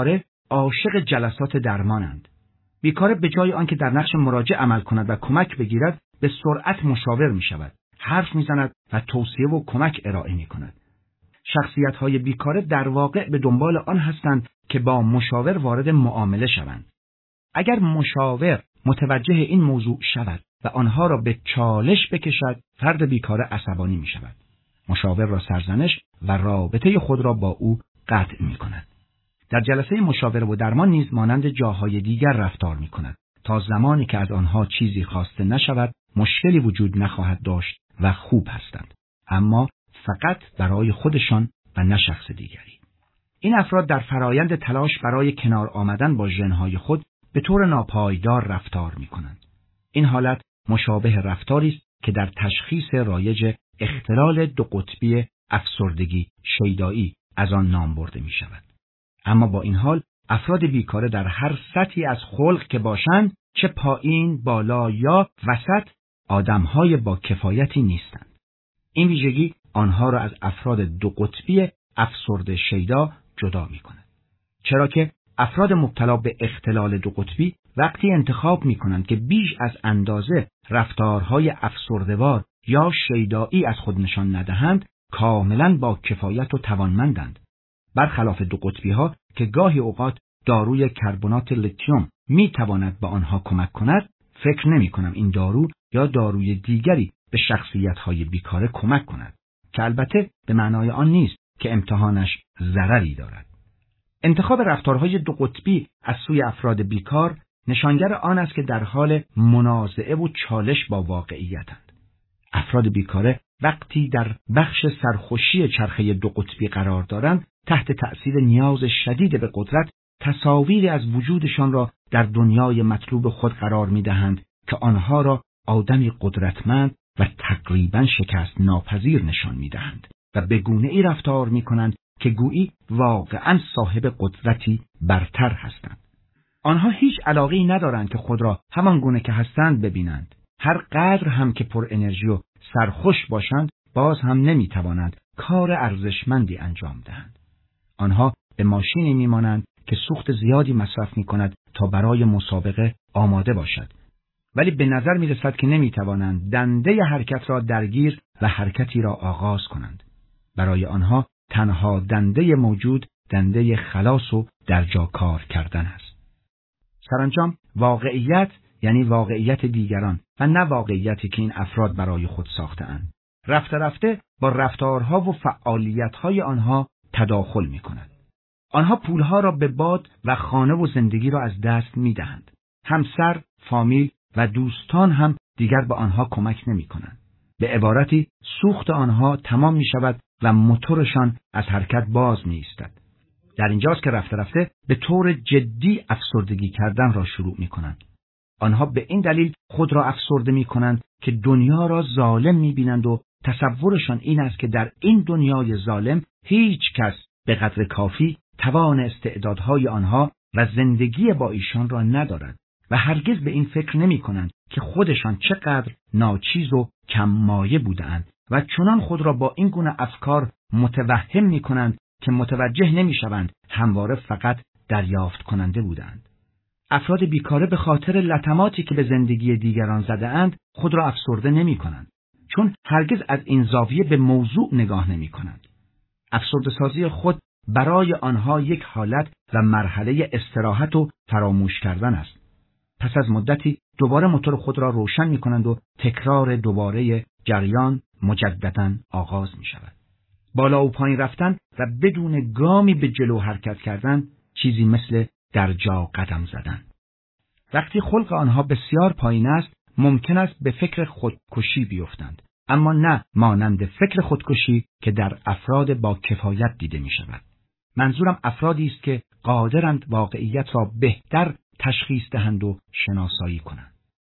عاشق جلسات درمانند. بیکاره به جای آنکه در نقش مراجع عمل کند و کمک بگیرد، به سرعت مشاور می شود، حرف می زند و توصیه و کمک ارائه می کند. شخصیت‌های بیکاره در واقع به دنبال آن هستند که با مشاور وارد معامله شوند. اگر مشاور متوجه این موضوع شود و آنها را به چالش بکشد، فرد بیکاره عصبانی می شود. مشاور را سرزنش و رابطه خود را با او قطع می کند. در جلسه مشاوره و درمان نیز مانند جاهای دیگر رفتار می کند. تا زمانی که از آنها چیزی خواسته نشود، مشکلی وجود نخواهد داشت و خوب هستند. اما فقط برای خودشان و نه شخص دیگری. این افراد در فرایند تلاش برای کنار آمدن با ژن‌های خود به طور ناپایدار رفتار می کنند. این حالت مشابه رفتاری است که در تشخیص رایج اختلال دو قطبی افسردگی شیدایی از آن نام برده می شود. اما با این حال افراد بیکاره در هر سطحی از خلق که باشند، چه پایین، بالا یا وسط، آدم‌های با کفایتی نیستند. این ویژگی آنها را از افراد دو قطبی افسرده شیدا جدا می کند. چرا که افراد مبتلا به اختلال دو قطبی وقتی انتخاب می کنند که بیش از اندازه رفتارهای افسرده‌وار یا شیدایی از خود نشان ندهند، کاملاً با کفایت و توانمندند. برخلاف دو قطبی ها که گاهی اوقات داروی کربنات لیتیوم می تواند به آنها کمک کند، فکر نمی کنم این دارو یا داروی دیگری به شخصیت های بیکاره کمک کند، که البته به معنای آن نیست که امتحانش ضرری دارد. انتخاب رفتارهای دو قطبی از سوی افراد بیکار نشانگر آن است که در حال منازعه و چالش با واقعیتند. افراد بیکاره وقتی در بخش سرخوشی چرخه دو قطبی قرار دارند، تحت تأثیر نیاز شدید به قدرت، تصاویری از وجودشان را در دنیای مطلوب خود قرار می‌دهند که آنها را آدمی قدرتمند و تقریباً شکست ناپذیر نشان می‌دهند و به گونه‌ای رفتار می‌کنند که گویی واقعاً صاحب قدرتی برتر هستند. آنها هیچ علاقه‌ای ندارند که خود را همان گونه که هستند ببینند. هر قدر هم که پر انرژی و سرخوش باشند، باز هم نمی‌توانند کار ارزشمندی انجام دهند. آنها به ماشینی می‌مانند که سوخت زیادی مصرف می‌کند تا برای مسابقه آماده باشد، ولی به نظر می‌رسد که نمی‌توانند دنده حرکت را درگیر و حرکتی را آغاز کنند. برای آنها تنها دنده موجود دنده خلاص و در جا کار کردن است. سرانجام واقعیت یعنی واقعیت دیگران و نه واقعیتی که این افراد برای خود ساخته‌اند. رفته رفته با رفتارها و فعالیت‌های آنها تداخل می‌کند. آنها پولها را به باد و خانه و زندگی را از دست می‌دهند. همسر، فامیل و دوستان هم دیگر به آنها کمک نمی‌کنند. به عبارتی سوخت آنها تمام می‌شود و موتورشان از حرکت باز می‌ایستد. در اینجاست که رفته رفته به طور جدی افسردگی کردن را شروع می‌کنند. آنها به این دلیل خود را افسرده می‌کنند که دنیا را ظالم می‌بینند و تصورشان این است که در این دنیای ظالم هیچ کس به قدر کافی توان استعدادهای آنها و زندگی با ایشان را ندارد و هرگز به این فکر نمی‌کنند که خودشان چقدر ناچیز و کم مایه بودند و چنان خود را با این گونه افکار متوهم می‌کنند که متوجه نمی‌شوند همواره فقط دریافت کننده بودند. افراد بیکاره به خاطر لطماتی که به زندگی دیگران زده‌اند خود را افسرده نمی‌کنند، چون هرگز از این زاویه به موضوع نگاه نمی‌کنند. افسرده سازی خود برای آنها یک حالت و مرحله استراحت و فراموش کردن است. پس از مدتی دوباره موتور خود را روشن می‌کنند و تکرار دوباره جریان مجدداً آغاز می‌شود. بالا و پایین رفتن و بدون گامی به جلو حرکت کردن چیزی مثل در جا قدم زدن. وقتی خلق آنها بسیار پایین است، ممکن است به فکر خودکشی بیفتند، اما نه مانند فکر خودکشی که در افراد با کفایت دیده می شود. منظورم افرادی است که قادرند واقعیت را بهتر تشخیص دهند و شناسایی کنند.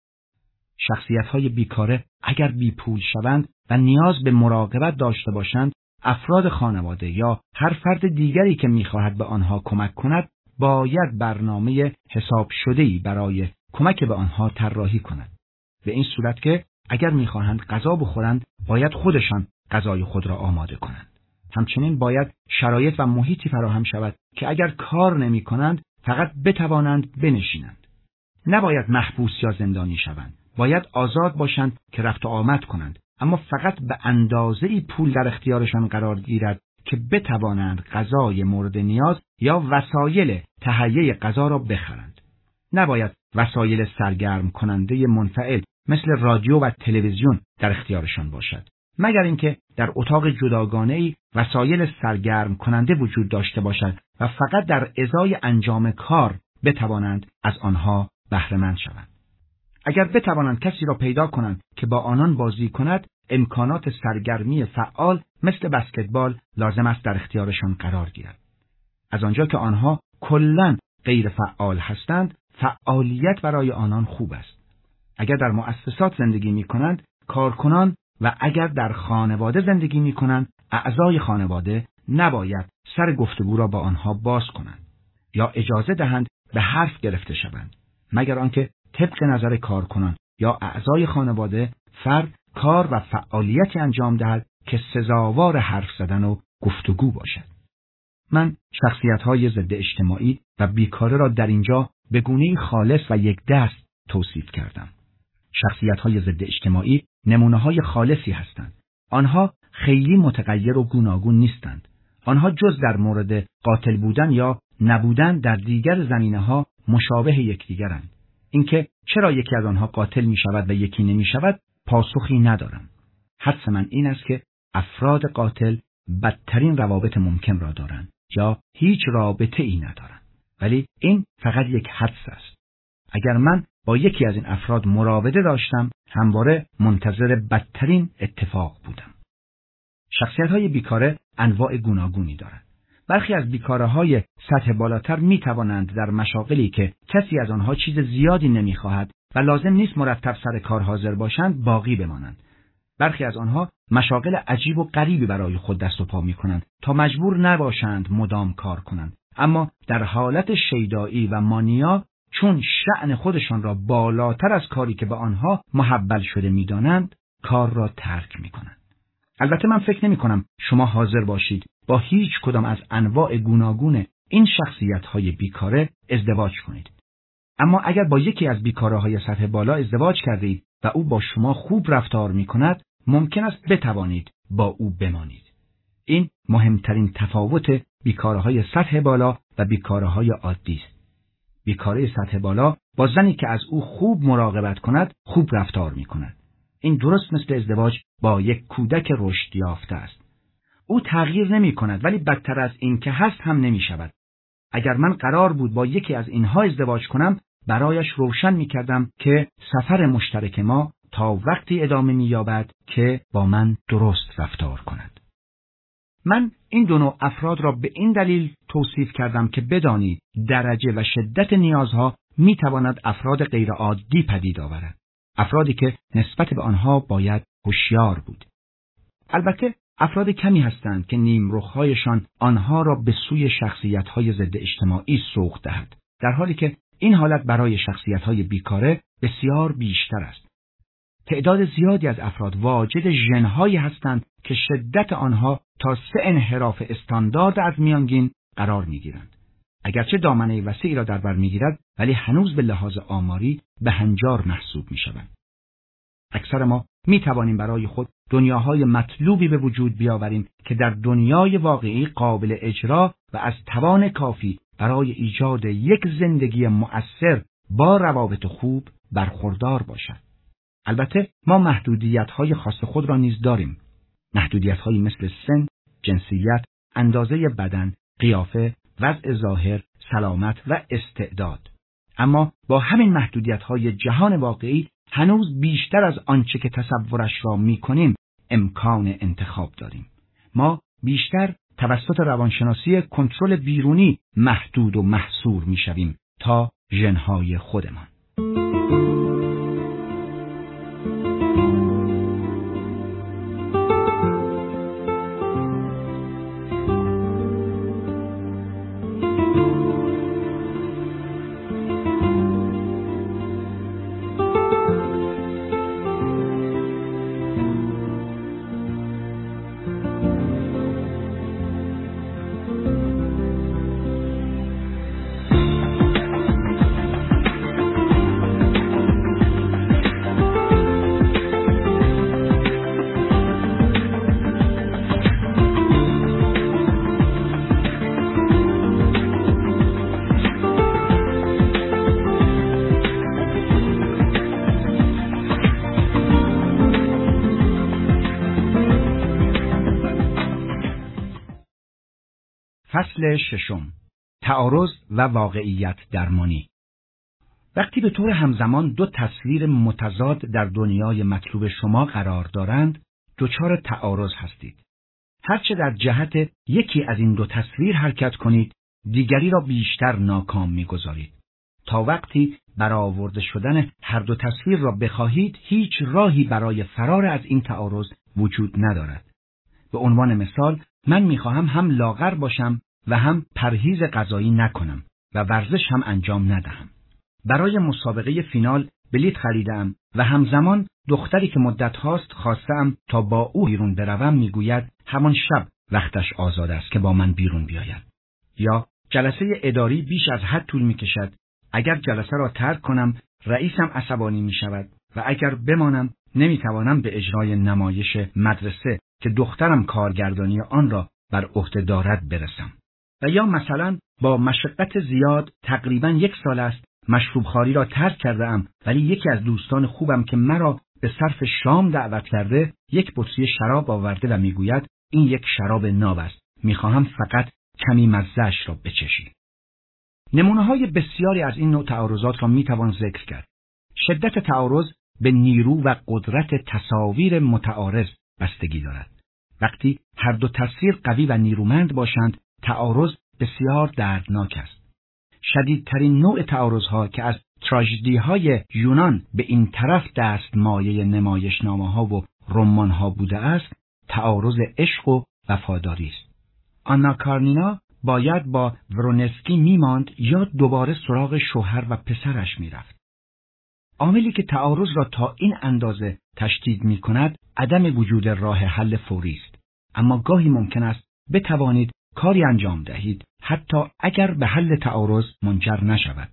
شخصیت‌های بیکاره اگر بی پول شوند و نیاز به مراقبت داشته باشند، افراد خانواده یا هر فرد دیگری که می‌خواهد به آنها کمک کند، باید برنامه حساب شده‌ای برای کمک به آنها طراحی کند. به این صورت که اگر می‌خواهند غذا بخورند، باید خودشان غذای خود را آماده کنند. همچنین باید شرایط و محیطی فراهم شود که اگر کار نمی‌کنند، فقط بتوانند بنشینند. نباید محبوس یا زندانی شوند. باید آزاد باشند که رفت و آمد کنند، اما فقط به اندازه‌ای پول در اختیارشان قرار گیرد که بتوانند غذای مورد نیاز یا وسایل تهیه غذا را بخرند. نباید وسایل سرگرم کننده منفعل مثل رادیو و تلویزیون در اختیارشان باشد، مگر اینکه در اتاق جداگانه‌ای وسایل سرگرم کننده وجود داشته باشد و فقط در ازای انجام کار بتوانند از آنها بهره مند شوند. اگر بتوانند کسی را پیدا کنند که با آنان بازی کند، امکانات سرگرمی فعال مثل بسکتبال لازم است در اختیارشان قرار گیرد. از آنجا که آنها کلاً غیر فعال هستند، فعالیت برای آنان خوب است. اگر در مؤسسات زندگی می کنند، کارکنان و اگر در خانواده زندگی می کنند، اعضای خانواده نباید سر گفتگو را با آنها باز کنند یا اجازه دهند به حرف گرفته شوند، مگر آنکه طبق نظر کارکنان یا اعضای خانواده فرد کار و فعالیتی انجام دهد که سزاوار حرف زدن و گفتگو باشد. من شخصیت‌های ضد اجتماعی و بیکاره را در اینجا به گونه‌ای خالص و یک دست توصیف کردم. شخصیت‌های ضد اجتماعی نمونه‌های خالصی هستند. آنها خیلی متغیر و گوناگون نیستند. آنها جز در مورد قاتل بودن یا نبودن در دیگر زمینه‌ها مشابه یکدیگرند. اینکه چرا یکی از آنها قاتل می‌شود و یکی نمی‌شود پاسخی ندارم. حدس من این است که افراد قاتل بدترین روابط ممکن را دارند یا هیچ رابطه‌ای ندارند. ولی این فقط یک حدس است. اگر من با یکی از این افراد مراوده داشتم، همواره منتظر بدترین اتفاق بودم. شخصیت‌های بیکاره انواع گوناگونی دارند. برخی از بیکاره‌های سطح بالاتر می‌توانند در مشاغلی که کسی از آنها چیز زیادی نمی‌خواهد و لازم نیست مرتب سر کار حاضر باشند باقی بمانند. برخی از آنها مشاغل عجیب و غریبی برای خود دست و پا می‌کنند تا مجبور نباشند مدام کار کنند، اما در حالت شیدایی و مانیا چون شأن خودشان را بالاتر از کاری که به آنها محول شده می‌دانند کار را ترک می‌کنند. البته من فکر نمی‌کنم شما حاضر باشید با هیچ کدام از انواع گوناگون این شخصیت‌های بیکاره ازدواج کنید. اما اگر با یکی از بیکاره‌های سطح بالا ازدواج کردید و او با شما خوب رفتار می‌کند، ممکن است بتوانید با او بمانید. این مهمترین تفاوت بیکاره‌های سطح بالا و بیکاره‌های عادی است. بیکاره سطح بالا با زنی که از او خوب مراقبت کند، خوب رفتار می‌کند. این درست مثل ازدواج با یک کودک رشد یافته است. او تغییر نمی‌کند ولی بدتر از این که هست هم نمی‌شود. اگر من قرار بود با یکی از اینها ازدواج کنم، برایش روشن می‌کردم که سفر مشترک ما تا وقتی ادامه می‌یابد که با من درست رفتار کند. من این دو نوع افراد را به این دلیل توصیف کردم که بدانید درجه و شدت نیازها می‌تواند افراد غیرعادی پدید آورد. افرادی که نسبت به آنها باید هوشیار بود. البته افراد کمی هستند که نیمرخ‌هایشان آنها را به سوی شخصیت‌های ضد اجتماعی سوق دهد، در حالی که این حالت برای شخصیت‌های بیکاره بسیار بیشتر است. تعداد زیادی از افراد واجد ژن‌هایی هستند که شدت آنها تا سه انحراف استاندارد از میانگین قرار می‌گیرند. اگرچه دامنه وسیعی را در بر می‌گیرد، ولی هنوز به لحاظ آماری به هنجار محسوب می‌شوند. اکثر ما می‌توانیم برای خود دنیاهای مطلوبی به وجود بیاوریم که در دنیای واقعی قابل اجرا و از توان کافی برای ایجاد یک زندگی مؤثر با روابط خوب برخوردار باشد. البته ما محدودیت‌های خاص خود را نیز داریم. محدودیت‌هایی مثل سن، جنسیت، اندازه بدن، قیافه، وضع ظاهر، سلامت و استعداد. اما با همین محدودیت‌های جهان واقعی هنوز بیشتر از آنچه که تصورش را می‌کنیم امکان انتخاب داریم. ما بیشتر توسط روانشناسی کنترل بیرونی محدود و محصور می‌شویم تا ژن‌های خودمان. فصل ششم، تعارض و واقعیت درمانی. وقتی به طور همزمان دو تصویر متضاد در دنیای مطلوب شما قرار دارند، دچار تعارض هستید. هرچه در جهت یکی از این دو تصویر حرکت کنید، دیگری را بیشتر ناکام می‌گذارید. تا وقتی برآورده شدن هر دو تصویر را بخواهید، هیچ راهی برای فرار از این تعارض وجود ندارد. به عنوان مثال، من می‌خواهم هم لاغر باشم و هم پرهیز غذایی نکنم و ورزش هم انجام ندهم. برای مسابقه فینال بلیط خریدم و همزمان دختری که مدت هاست خواستم تا با او بیرون بروم میگوید همان شب وقتش آزاد است که با من بیرون بیاید. یا جلسه اداری بیش از حد طول میکشد. اگر جلسه را ترک کنم رئیسم عصبانی می شود و اگر بمانم نمیتوانم به اجرای نمایش مدرسه که دخترم کارگردانی آن را بر عهده دارد برسم. و یا مثلا با مشقت زیاد تقریباً یک سال است مشروب خواری را ترک کرده ام، ولی یکی از دوستان خوبم که مرا به صرف شام دعوت کرده یک بطری شراب آورده و میگوید این یک شراب ناب است، میخواهم فقط کمی مزه‌اش را بچشی. نمونه‌های بسیاری از این نوع تعارضات را میتوان ذکر کرد. شدت تعارض به نیرو و قدرت تصاویر متعارض بستگی دارد. وقتی هر دو تصویر قوی و نیرومند باشند، تعارض بسیار دردناک است. شدیدترین نوع تعارضها که از تراژدی‌های یونان به این طرف دست مایه نمایشنامه‌ها و رمان‌ها بوده است، تعارض عشق و وفاداری است. آنا کارنینا باید با ورونسکی میماند یا دوباره سراغ شوهر و پسرش میرفت. عاملی که تعارض را تا این اندازه تشدید می‌کند، عدم وجود راه حل فوری است. اما گاهی ممکن است بتوانید کاری انجام دهید حتی اگر به حل تعارض منجر نشود.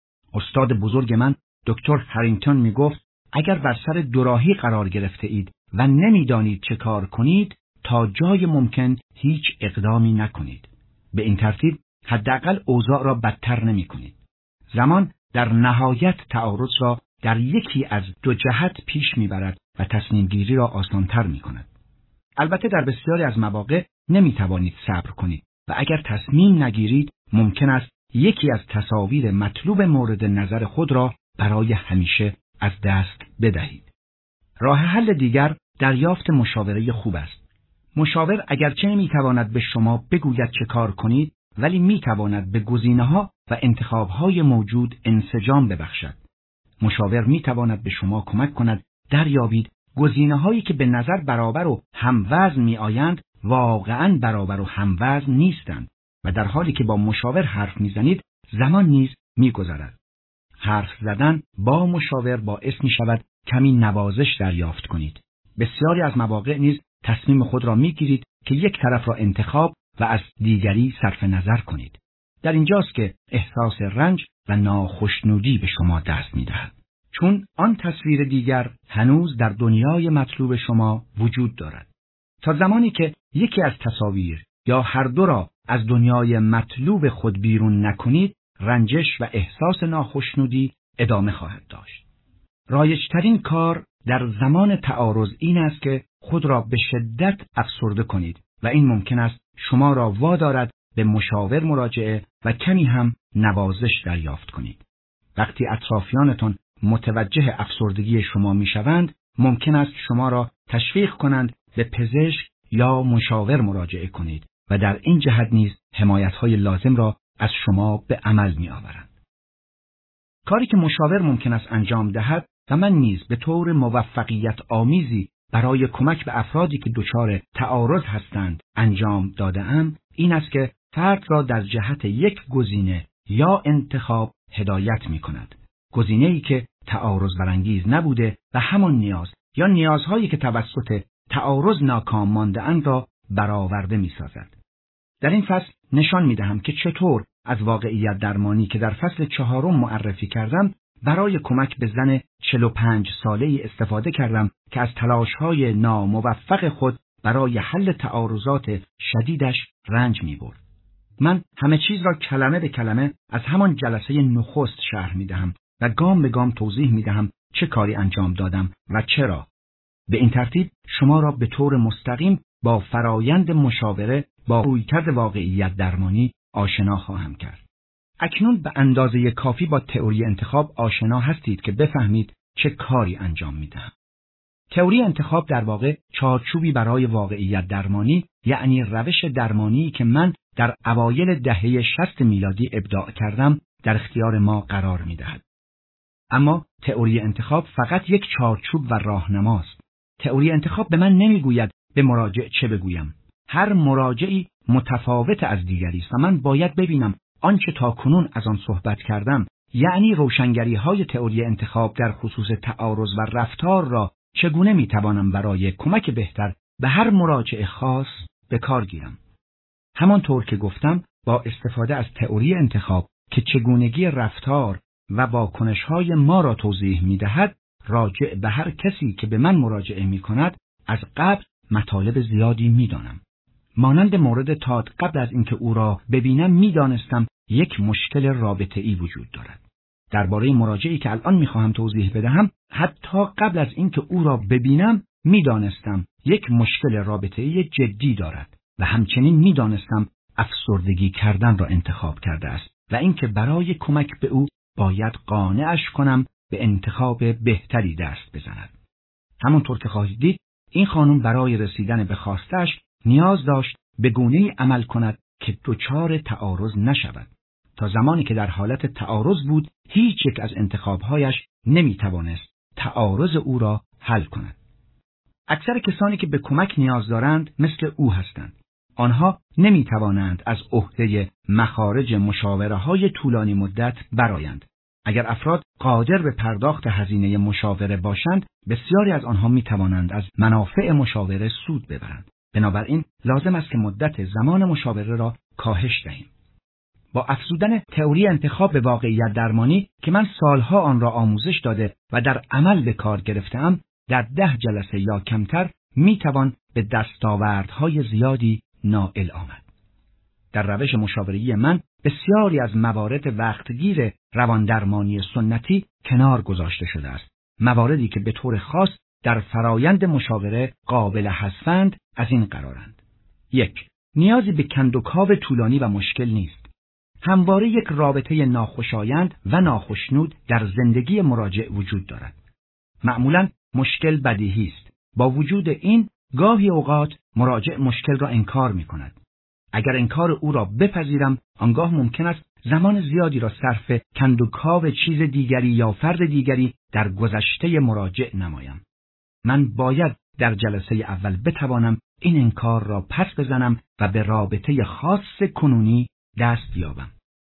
استاد بزرگ من دکتر هرینگتون می گفت اگر بر سر دوراهی قرار گرفته اید و نمیدانید چه کار کنید، تا جای ممکن هیچ اقدامی نکنید. به این ترتیب حداقل اوضاع را بدتر نمی کنید. زمان در نهایت تعارض را در یکی از دو جهت پیش می برد و تصمیم گیری را آسانتر می کند. البته در بسیاری از مواقع نمی توانید صبر کنید و اگر تصمیم نگیرید ممکن است یکی از تصاویر مطلوب مورد نظر خود را برای همیشه از دست بدهید. راه حل دیگر دریافت مشاوره خوب است. مشاور اگرچه نمی تواند به شما بگوید چه کار کنید، ولی می تواند به گزینه‌ها و انتخاب‌های موجود انسجام ببخشد. مشاور می تواند به شما کمک کند دریابید گزینه‌هایی که به نظر برابر و هموزن می آیند واقعاً برابر و هموزن نیستند و در حالی که با مشاور حرف میزنید زمان نیز میگذرد. حرف زدن با مشاور باعث می شود کمی نوازش دریافت کنید. بسیاری از مواقع نیز تصمیم خود را میگیرید که یک طرف را انتخاب و از دیگری صرف نظر کنید. در اینجاست که احساس رنج و ناخشنودی به شما دست میدهد، چون آن تصویر دیگر هنوز در دنیای مطلوب شما وجود دارد. تا زمانی که یکی از تصاویر یا هر دو را از دنیای مطلوب خود بیرون نکنید، رنجش و احساس ناخشنودی ادامه خواهد داشت. رایج‌ترین کار در زمان تعارض این است که خود را به شدت افسرده کنید و این ممکن است شما را وادارد به مشاور مراجعه و کمی هم نوازش دریافت کنید. وقتی اطرافیانتان متوجه افسردگی شما میشوند، ممکن است شما را تشویق کنند به پزشک یا مشاور مراجعه کنید و در این جهت نیز حمایت‌های لازم را از شما به عمل می‌آورند. کاری که مشاور ممکن است انجام دهد و من نیز به طور موفقیت آمیزی برای کمک به افرادی که دچار تعارض هستند انجام داده‌ام، این است که فرد را در جهت یک گزینه یا انتخاب هدایت می‌کند. گزینه‌ای که تعارض برانگیز نبوده و همان نیاز یا نیازهایی که توسط تعارض ناکام مانده‌اند را برآورده می‌سازد. در این فصل نشان می‌دهم که چطور از واقعیت درمانی که در فصل چهارم معرفی کردم برای کمک به زن چهل و پنج ساله‌ای استفاده کردم که از تلاش‌های ناموفق خود برای حل تعارضات شدیدش رنج می‌برد. من همه چیز را کلمه به کلمه از همان جلسه نخست شرح می‌دهم و گام به گام توضیح می‌دهم چه کاری انجام دادم و چرا. به این ترتیب شما را به طور مستقیم با فرایند مشاوره با رویکرد واقعیت درمانی آشنا خواهم کرد. اکنون به اندازه کافی با تئوری انتخاب آشنا هستید که بفهمید چه کاری انجام میدهم. تئوری انتخاب در واقع چارچوبی برای واقعیت درمانی، یعنی روش درمانی که من در اوایل دهه شصت میلادی ابداع کردم، در اختیار ما قرار میدهد. اما تئوری انتخاب فقط یک چارچوب و راهنماست. تئوری انتخاب به من نمیگوید به مراجع چه بگویم. هر مراجعی متفاوت از دیگری است و من باید ببینم آنچه تاکنون از آن صحبت کردم، یعنی روشنگری‌های تئوری انتخاب در خصوص تعارض و رفتار را چگونه میتوانم برای کمک بهتر به هر مراجع خاص به کار گیرم. همانطور که گفتم، با استفاده از تئوری انتخاب که چگونگی رفتار و واکنش‌های ما را توضیح می‌دهد، راجع به هر کسی که به من مراجعه می‌کند از قبل مطالب زیادی می‌دانم. مانند مورد تاد، قبل از اینکه او را ببینم می‌دانستم یک مشکل رابطه‌ای وجود دارد. درباره مراجعی که الان می‌خواهم توضیح بدهم، حتی قبل از اینکه او را ببینم می‌دانستم یک مشکل رابطه‌ای جدی دارد و همچنین می‌دانستم افسردگی کردن را انتخاب کرده است و اینکه برای کمک به او باید قانعش کنم به انتخاب بهتری دست بزند. همونطور که خواهید دید، این خانم برای رسیدن به خواستش نیاز داشت به گونه‌ای عمل کند که دچار تعارض نشود. تا زمانی که در حالت تعارض بود، هیچ یک از انتخاب‌هایش نمی‌توانست تعارض او را حل کند. اکثر کسانی که به کمک نیاز دارند مثل او هستند. آنها نمی‌توانند از عهده مخارج مشاوره‌های طولانی مدت برآیند. اگر افراد قادر به پرداخت هزینه مشاوره باشند، بسیاری از آنها می‌توانند از منافع مشاوره سود ببرند. بنابراین لازم است که مدت زمان مشاوره را کاهش دهیم. با افزودن تئوری انتخاب به واقعیت درمانی که من سالها آن را آموزش داده و در عمل به کار گرفته‌ام، در ده جلسه یا کمتر می‌توان به دستاوردهای زیادی نائل آمد. در روش مشاوره‌ای من بسیاری از موارد وقتگیر رواندرمانی سنتی کنار گذاشته شده است. مواردی که به طور خاص در فرایند مشاوره قابل حذفند از این قرارند. یک، نیازی به کندوکاو طولانی و مشکل نیست. همواره یک رابطه ناخوشایند و ناخشنود در زندگی مراجع وجود دارد. معمولاً مشکل بدیهی است. با وجود این، گاهی اوقات مراجع مشکل را انکار می کند. اگر انکار او را بپذیرم، آنگاه ممکن است زمان زیادی را صرف کندوکاو چیز دیگری یا فرد دیگری در گذشته مراجع نمایم. من باید در جلسه اول بتوانم این انکار را پس بزنم و به رابطه خاص کنونی دست یابم.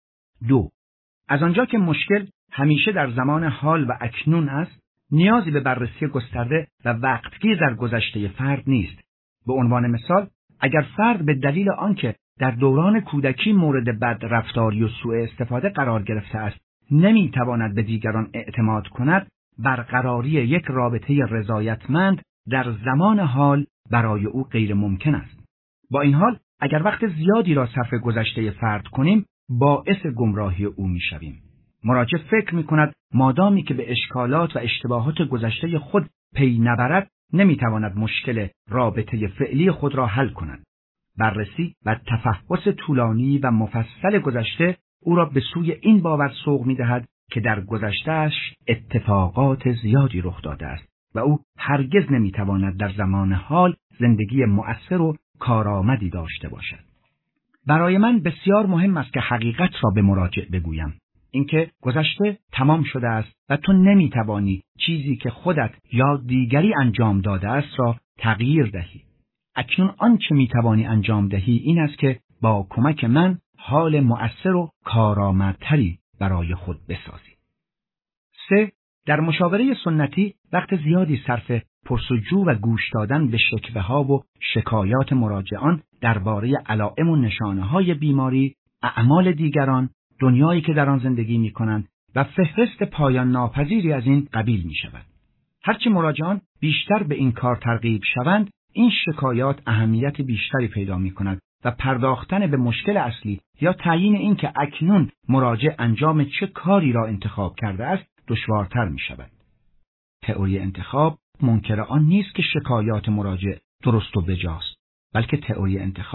دو، از آنجا که مشکل همیشه در زمان حال و اکنون است، نیازی به بررسی گسترده و وقتگیر در گذشته فرد نیست. به عنوان مثال، اگر فرد به دلیل آنکه در دوران کودکی مورد بد رفتاری و سوء استفاده قرار گرفته است، نمیتواند به دیگران اعتماد کند، برقراری یک رابطه رضایتمند در زمان حال برای او غیر ممکن است. با این حال، اگر وقت زیادی را صرف گذشته فرد کنیم، باعث گمراهی او میشویم. مراجع فکر میکند مادامی که به اشکالات و اشتباهات گذشته خود پی نبرد، نمیتواند مشکل رابطه فعلی خود را حل کند. بررسی و تفحص طولانی و مفصل گذشته او را به سوی این باور سوق می‌دهد که در گذشته‌اش اتفاقات زیادی رخ داده است و او هرگز نمی‌تواند در زمان حال زندگی مؤثر و کارآمدی داشته باشد. برای من بسیار مهم است که حقیقت را به مراجع بگویم. اینکه گذشته تمام شده است و تو نمی‌توانی چیزی که خودت یا دیگری انجام داده است را تغییر دهی. اکنون آنچه می‌توانی انجام دهی این است که با کمک من حال مؤثر و کارآمدتری برای خود بسازی. سه، در مشاوره سنتی وقت زیادی صرف پرسجو و گوش دادن به شکوه‌ها و شکایات مراجعان درباره علائم و نشانه‌های بیماری، اعمال دیگران، دنیایی که در آن زندگی می‌کنند و فهرست پایان ناپذیری از این قبیل می‌شود. هرچه مراجعان بیشتر به این کار ترغیب شوند، این شکایات اهمیت بیشتری پیدا می‌کند و پرداختن به مشکل اصلی یا تعیین این که اکنون مراجع انجام چه کاری را انتخاب کرده است دشوارتر می‌شود. تئوری انتخاب منکر آن نیست که شکایات مراجع درست و بجاست، بلکه تئوری انتخاب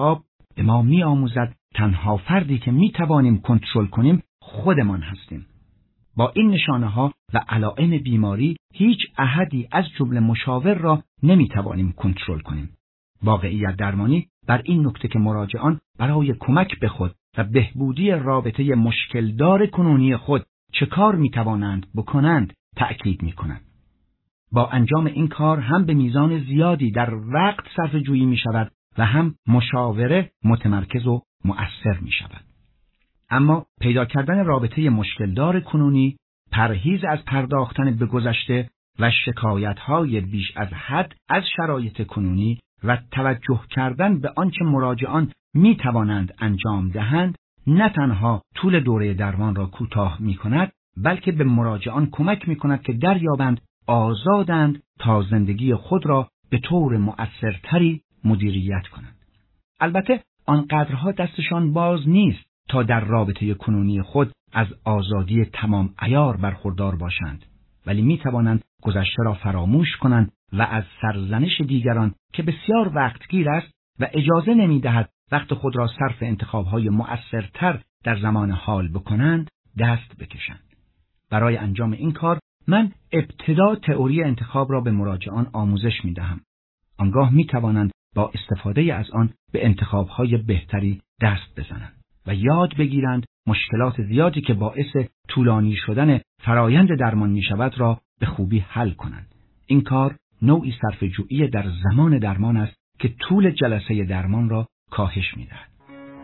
به ما می‌آموزد تنها فردی که می‌توانیم کنترل کنیم خودمان هستیم. با این نشانه‌ها و علائم بیماری هیچ احدی از جمله مشاور را نمی‌توانیم کنترل کنیم. واقعیت درمانی بر این نکته که مراجعان برای کمک به خود و بهبودی رابطه مشکلدار کنونی خود چه کار می‌توانند بکنند تأکید می‌کنند. با انجام این کار هم به میزان زیادی در وقت صرف جویی می‌شود و هم مشاوره متمرکز و مؤثر می‌شود. اما پیدا کردن رابطه مشکلدار کنونی، پرهیز از پرداختن به گذشته و شکایت‌های بیش از حد از شرایط کنونی و توجه کردن به آنچه مراجعان می‌توانند انجام دهند، نه تنها طول دوره درمان را کوتاه می‌کند، بلکه به مراجعان کمک می‌کند که دریابند آزادند تا زندگی خود را به طور مؤثرتری مدیریت کنند. البته آنقدرها دستشان باز نیست تا در رابطه کنونی خود از آزادی تمام عیار برخوردار باشند، ولی می توانند گذشته را فراموش کنند و از سرزنش دیگران که بسیار وقتگیر است و اجازه نمی دهد وقت خود را صرف انتخاب‌های مؤثرتر در زمان حال بکنند دست بکشند. برای انجام این کار من ابتدا تئوری انتخاب را به مراجعان آموزش می دهم. آنگاه می توانند با استفاده از آن به انتخاب‌های بهتری دست بزنند و یاد بگیرند مشکلات زیادی که باعث طولانی شدن فرایند درمان می شود را به خوبی حل کنند. این کار نوعی صرفه‌جویی در زمان درمان است که طول جلسه درمان را کاهش می دهد.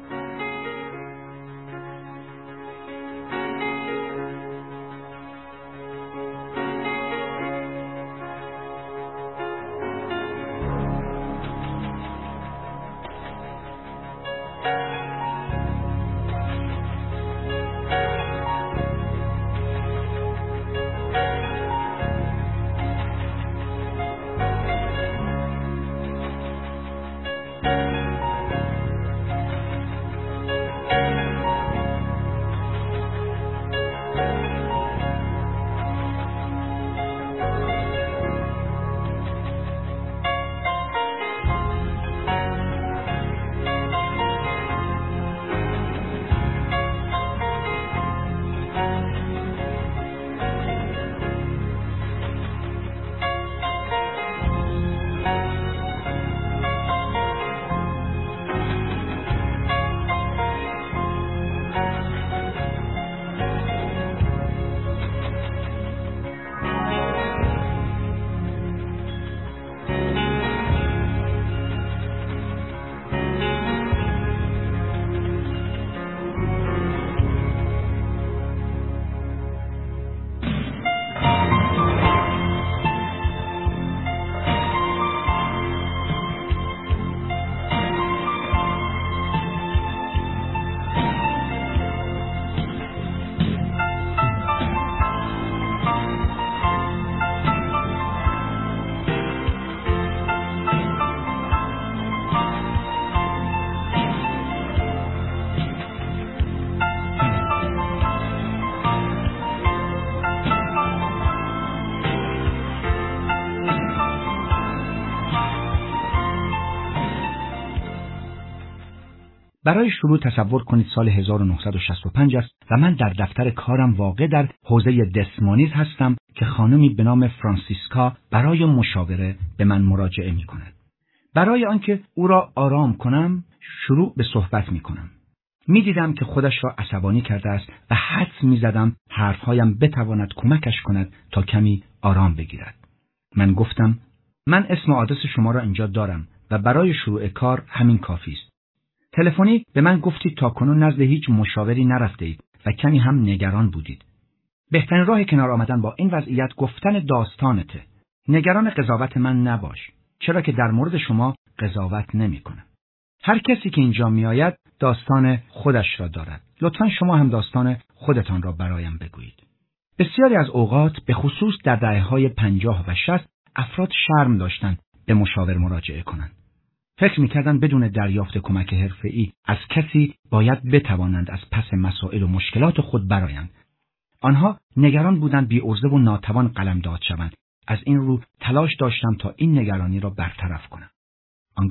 برای شروع تصور کنید سال هزار و نهصد و شصت و پنج است و من در دفتر کارم واقع در حوزه دسمانیز هستم که خانمی به نام فرانسیسکا برای مشاوره به من مراجعه می کند. برای آنکه او را آرام کنم شروع به صحبت می کنم. می دیدم که خودش را عصبانی کرده است و حدس می زدم حرفهایم بتواند کمکش کند تا کمی آرام بگیرد. من گفتم من اسم و آدرس شما را اینجا دارم و برای شروع کار همین کافی است. تلفنی به من گفتید تا کنون نزد هیچ مشاوری نرفته اید و کمی هم نگران بودید. بهترین راه کنار آمدن با این وضعیت گفتن داستانته. نگران قضاوت من نباش، چرا که در مورد شما قضاوت نمی کنم. هر کسی که اینجا می آید داستان خودش را دارد. لطفاً شما هم داستان خودتان را برایم بگویید. بسیاری از اوقات به خصوص در دهه‌های پنجاه و شصت افراد شرم داشتند به مشاور مراجعه کنند. فکر می‌کردند بدون دریافت کمک حرفه‌ای از کسی باید بتوانند از پس مسائل و مشکلات خود برآیند. آنها نگران بودند بی‌عرضه و ناتوان قلمداد شوند. از این رو تلاش داشتم تا این نگرانی را برطرف کنم. آنگاه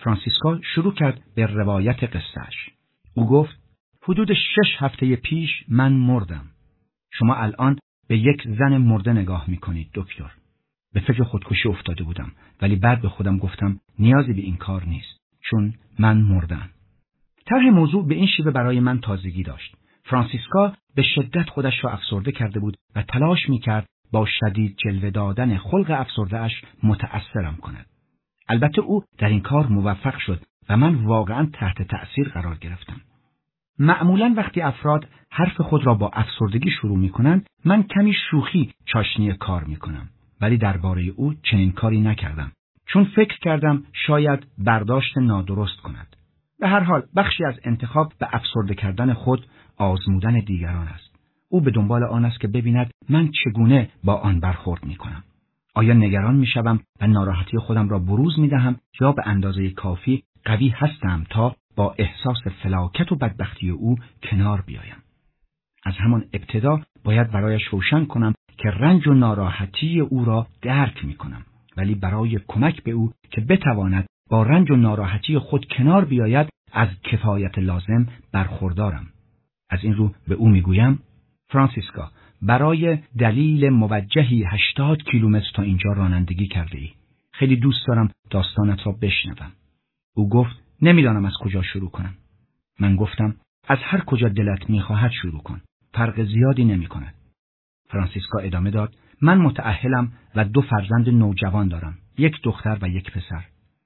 فرانسیسکا شروع کرد به روایت قصهش. او گفت حدود شش هفته پیش من مردم. شما الان به یک زن مرده نگاه میکنید دکتر. به فکر خودکشی افتاده بودم ولی بعد به خودم گفتم نیازی به این کار نیست چون من مردم. طرح موضوع به این شیوه برای من تازگی داشت. فرانسیسکا به شدت خودش را افسرده کرده بود و تلاش میکرد با شدید جلوه دادن خلق افسرده‌اش متأثرم کند. البته او در این کار موفق شد و من واقعا تحت تأثیر قرار گرفتم. معمولاً وقتی افراد حرف خود را با افسردگی شروع میکنند، من کمی شوخی چاشنی کار میکنم. ولی درباره او چنین کاری نکردم. چون فکر کردم شاید برداشت نادرست کند. به هر حال بخشی از انتخاب به افسرده کردن خود آزمودن دیگران است. او به دنبال آن است که ببیند من چگونه با آن برخورد میکنم. آیا نگران میشوم و ناراحتی خودم را بروز میدهم یا به اندازه کافی قوی هستم تا با احساس فلاکت و بدبختی او کنار بیایم. از همان ابتدا باید برایش روشن کنم که رنج و ناراحتی او را درک میکنم، ولی برای کمک به او که بتواند با رنج و ناراحتی خود کنار بیاید از کفایت لازم برخوردارم. از این رو به او میگویم فرانسیسکا، برای دلیل موجهی هشتاد کیلومتر تا اینجا رانندگی کرده ای. خیلی دوست دارم داستانت را بشنوم. او گفت نمیدانم از کجا شروع کنم. من گفتم از هر کجا دلت میخواهد شروع کن. فرق زیادی نمی کند. فرانسیسکا ادامه داد من متأهلم و دو فرزند نوجوان دارم. یک دختر و یک پسر.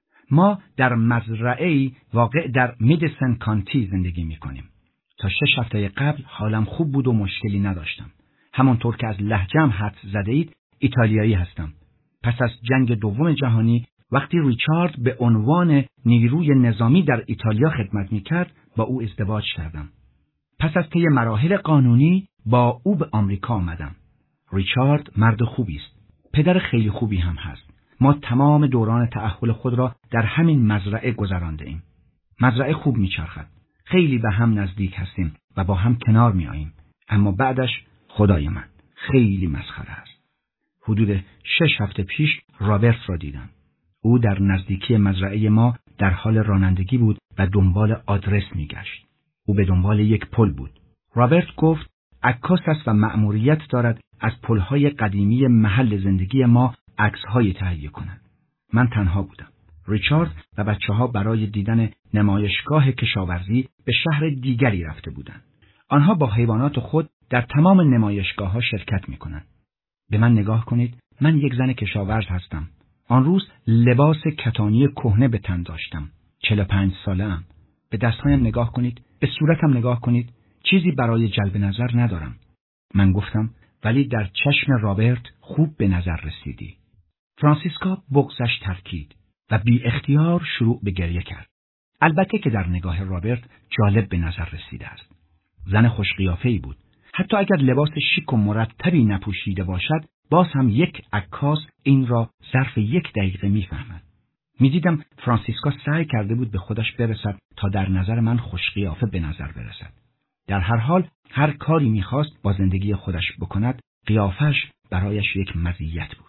ما در مزرعه‌ای واقع در میدیسن کانتی زندگی میکنیم. تا شش هفته قبل حالم خوب بود و مشکلی نداشتم. همانطور که از لهجه‌ام حدس زده اید ایتالیایی هستم. پس از جنگ دوم جهانی وقتی ریچارد به عنوان نیروی نظامی در ایتالیا خدمت میکرد با او ازدواج کردم. پس از طی مراحل قانونی با او به آمریکا آمدم. ریچارد مرد خوبی است. پدر خیلی خوبی هم هست. ما تمام دوران تأهل خود را در همین مزرعه گذرانده ایم. مزرعه خوب میچرخد. خیلی به هم نزدیک هستیم و با هم کنار میاییم. اما بعدش خدای من خیلی مسخره است. حدود شش هفته پیش رابرت را دیدم. او در نزدیکی مزرعه ما در حال رانندگی بود و دنبال آدرس میگشت. او به دنبال یک پل بود. رابرت گفت عکاس است و مأموریت دارد از پل‌های قدیمی محل زندگی ما عکس‌های تهیه کند. من تنها بودم. ریچارد و بچه‌ها برای دیدن نمایشگاه کشاورزی به شهر دیگری رفته بودند. آنها با حیوانات خود در تمام نمایشگاه‌ها شرکت می‌کنند. به من نگاه کنید، من یک زن کشاورز هستم. آن روز لباس کتانی کهنه به تن داشتم. چهل و پنج ساله‌ام. به دستهایم نگاه کنید، به صورتم نگاه کنید. چیزی برای جلب نظر ندارم. من گفتم ولی در چشم رابرت خوب به نظر رسیدی. فرانسیسکا بغضش ترکید و بی اختیار شروع به گریه کرد. البته که در نگاه رابرت جالب به نظر رسیده است. زن خوش قیافه‌ای بود. حتی اگر لباس شیک و مرتبی نپوشیده باشد، باز هم یک عکاس این را ظرف یک دقیقه میفهمد. میدیدم فرانسیسکا سعی کرده بود به خودش برسد تا در نظر من خوش قیافه به نظر برسد. در هر حال هر کاری میخواست با زندگی خودش بکند، قیافش برایش یک مزیت بود.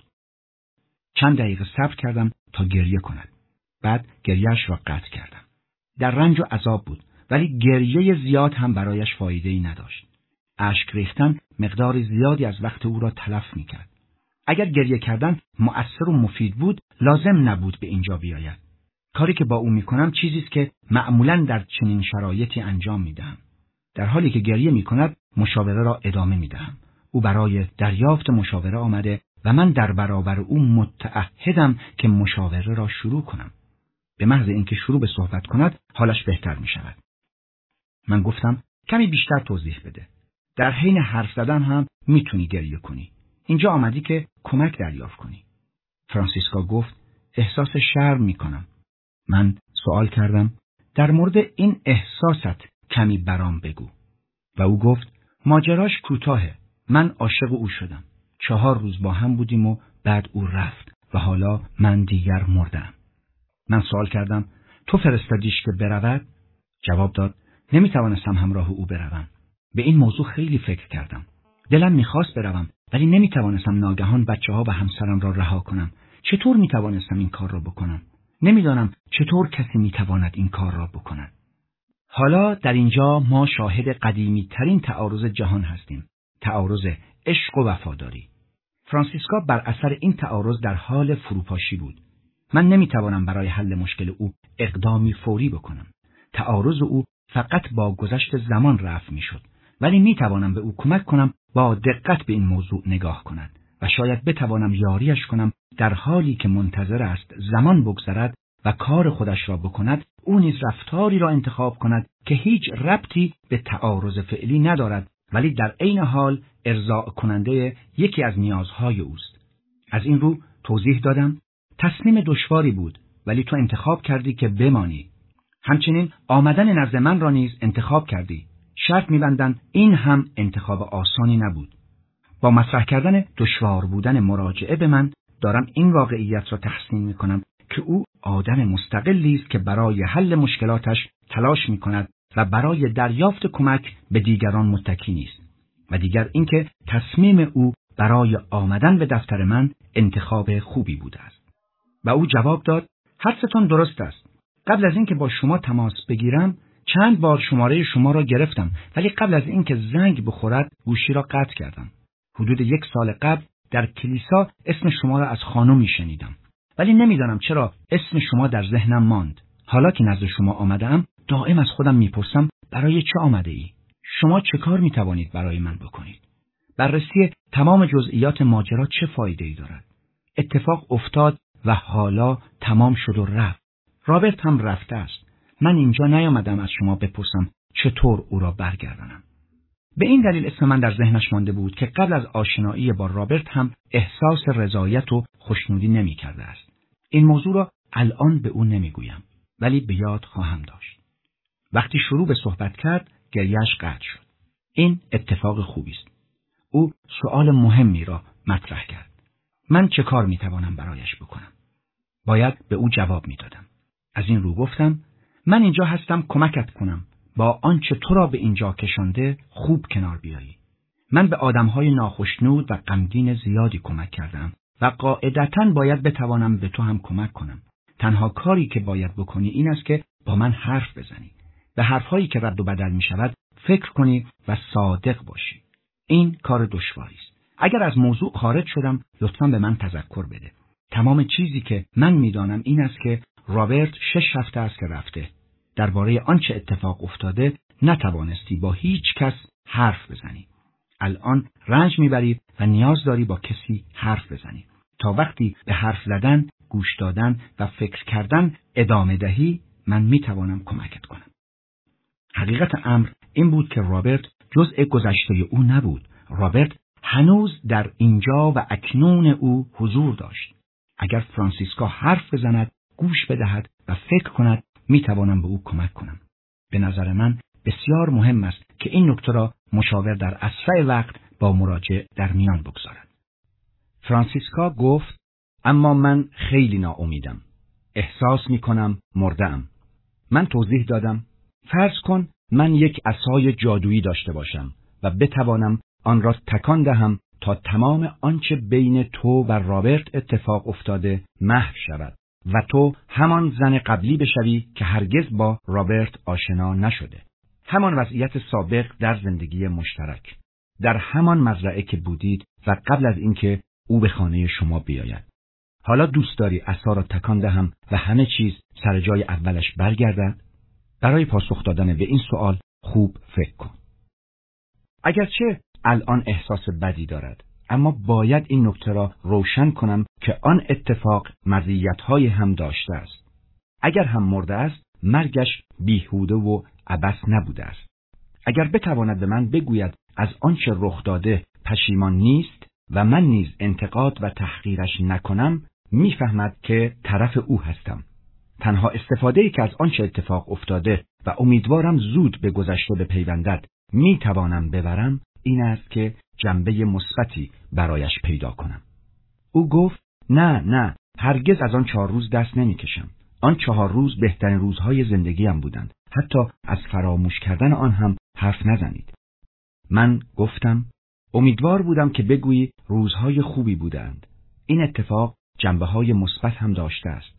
چند دقیقه صبر کردم تا گریه کند. بعد گریهش را قطع کردم. در رنج و عذاب بود، ولی گریه زیاد هم برایش فایده‌ای نداشت. اشک ریختن مقدار زیادی از وقت او را تلف میکرد. اگر گریه کردن مؤثر و مفید بود، لازم نبود به اینجا بیاید. کاری که با او میکنم چیزی است که معمولاً در چنین شرایطی انجام میدهم. در حالی که گریه میکند، مشاوره را ادامه میدهم. او برای دریافت مشاوره آمده و من در برابر او متعهدم که مشاوره را شروع کنم. به محض اینکه شروع به صحبت کند، حالش بهتر میشود. من گفتم کمی بیشتر توضیح بده. در حین حرف زدن هم میتونی گریه کنی. اینجا آمدی که کمک دریافت کنی. فرانسیسکا گفت احساس شرم میکنم. من سوال کردم در مورد این احساست کمی برام بگو. و او گفت ماجراش کوتاهه. من عاشق او شدم. چهار روز با هم بودیم و بعد او رفت و حالا من دیگر مردم. من سوال کردم تو فرستادیش که برود؟ جواب داد نمیتوانستم همراه او بروم. به این موضوع خیلی فکر کردم. دلم میخواست بروم ولی نمیتوانستم ناگهان بچه‌ها و همسرم را رها کنم. چطور میتوانستم این کار را بکنم؟ نمیدانم چطور کسی میتواند این کار را بکند. حالا در اینجا ما شاهد قدیمی ترین تعارض جهان هستیم. تعارض عشق و وفاداری. فرانسیسکا بر اثر این تعارض در حال فروپاشی بود. من نمیتوانم برای حل مشکل او اقدامی فوری بکنم. تعارض او فقط با گذشت زمان رفع میشد، ولی میتوانم به او کمک کنم با دقت به این موضوع نگاه کند و شاید بتوانم یاریش کنم در حالی که منتظر است زمان بگذرد و کار خودش را بکند، او نیز رفتاری را انتخاب کند که هیچ ربطی به تعارض فعلی ندارد، ولی در عین حال ارضاء کننده یکی از نیازهای اوست. از این رو توضیح دادم تصمیم دشواری بود، ولی تو انتخاب کردی که بمانی. همچنین آمدن نزد من را نیز انتخاب کردی. شرط می‌بندم این هم انتخاب آسانی نبود. با مطرح کردن دشوار بودن مراجعه به من دارم این واقعیت را تحسین می‌کنم که او آدم مستقلی است که برای حل مشکلاتش تلاش می‌کند و برای دریافت کمک به دیگران متکی نیست. و دیگر اینکه تصمیم او برای آمدن به دفتر من انتخاب خوبی بوده است. و او جواب داد: حدستان درست است. قبل از اینکه با شما تماس بگیرم چند بار شماره شما را گرفتم، ولی قبل از اینکه زنگ بخورد گوشی را قطع کردم. حدود یک سال قبل در کلیسا اسم شما را از خانمی شنیدم، ولی نمیدانم چرا اسم شما در ذهنم ماند. حالا که نزد شما آمدم دائم از خودم میپرسم برای چه آمده ای؟ شما چه کار میتوانید برای من بکنید؟ بررسی تمام جزئیات ماجرا چه فایده ای دارد؟ اتفاق افتاد و حالا تمام شد و رفت. رابرت هم رفته است. من اینجا نیامدم از شما بپرسم چطور او را برگردانم. به این دلیل اسم من در ذهنش مانده بود که قبل از آشنایی با رابرت هم احساس رضایت و خوشنودی نمی کرده است. این موضوع را الان به او نمیگویم، ولی به یاد خواهم داشت. وقتی شروع به صحبت کرد گریه‌اش قطع شد. این اتفاق خوبی است. او سؤال مهمی را مطرح کرد. من چه کار میتوانم برایش بکنم؟ باید به او جواب میدادم. از این رو گفتم من اینجا هستم کمکت کنم با آنچه تو را به اینجا کشانده خوب کنار بیایی. من به آدمهای ناخشنود و غمگین زیادی کمک کردم و قاعدتاً باید بتوانم به تو هم کمک کنم. تنها کاری که باید بکنی این است که با من حرف بزنی. به حرفهایی که رد و بدل می شود فکر کنی و صادق باشی. این کار دشواری است. اگر از موضوع خارج شدم لطفاً به من تذکر بده. تمام چیزی که من میدانم این است که رابرت شش هفته است که رفته. درباره آنچه اتفاق افتاده نتوانستی با هیچ کس حرف بزنی. الان رنج میبری و نیاز داری با کسی حرف بزنی. تا وقتی به حرف زدن، گوش دادن و فکر کردن ادامه دهی من میتوانم کمکت کنم. حقیقت امر این بود که رابرت جزء گذشته او نبود. رابرت هنوز در اینجا و اکنون او حضور داشت. اگر فرانسیسکا حرف بزند، گوش بدهد و فکر کند، میتوانم به او کمک کنم. به نظر من بسیار مهم است که این نکته را مشاور در اسرع وقت با مراجع در میان بگذارد. فرانسیسکا گفت: اما من خیلی ناامیدم. احساس میکنم مرده‌ام. من توضیح دادم: فرض کن من یک عصای جادویی داشته باشم و بتوانم آن را تکان دهم تا تمام آنچه بین تو و رابرت اتفاق افتاده محو شود و تو همان زن قبلی بشوی که هرگز با رابرت آشنا نشده. همان وضعیت سابق در زندگی مشترک. در همان مزرعه که بودید و قبل از اینکه او به خانه شما بیاید. حالا دوست داری عصا را تکان دهم و همه چیز سر جای اولش برگردد؟ برای پاسخ دادن به این سوال خوب فکر کن. اگرچه الان احساس بدی دارد، اما باید این نکته را روشن کنم که آن اتفاق مزیت‌های هم داشته است. اگر هم مرده است، مرگش بیهوده و عبث نبوده است. اگر بتواند به من بگوید از آنچه رخ داده پشیمان نیست و من نیز انتقاد و تحقیرش نکنم، میفهمد که طرف او هستم. تنها استفاده‌ای که از آنچه اتفاق افتاده و امیدوارم زود به گذشته بپیوندد میتوانم ببرم این است که جنبه مثبتی برایش پیدا کنم. او گفت: نه نه، هرگز از آن چهار روز دست نمیکشم. آن چهار روز بهترین روزهای زندگیم بودند. حتی از فراموش کردن آن هم حرف نزنید. من گفتم: امیدوار بودم که بگویی روزهای خوبی بودند. این اتفاق جنبه‌های مثبت هم داشته است.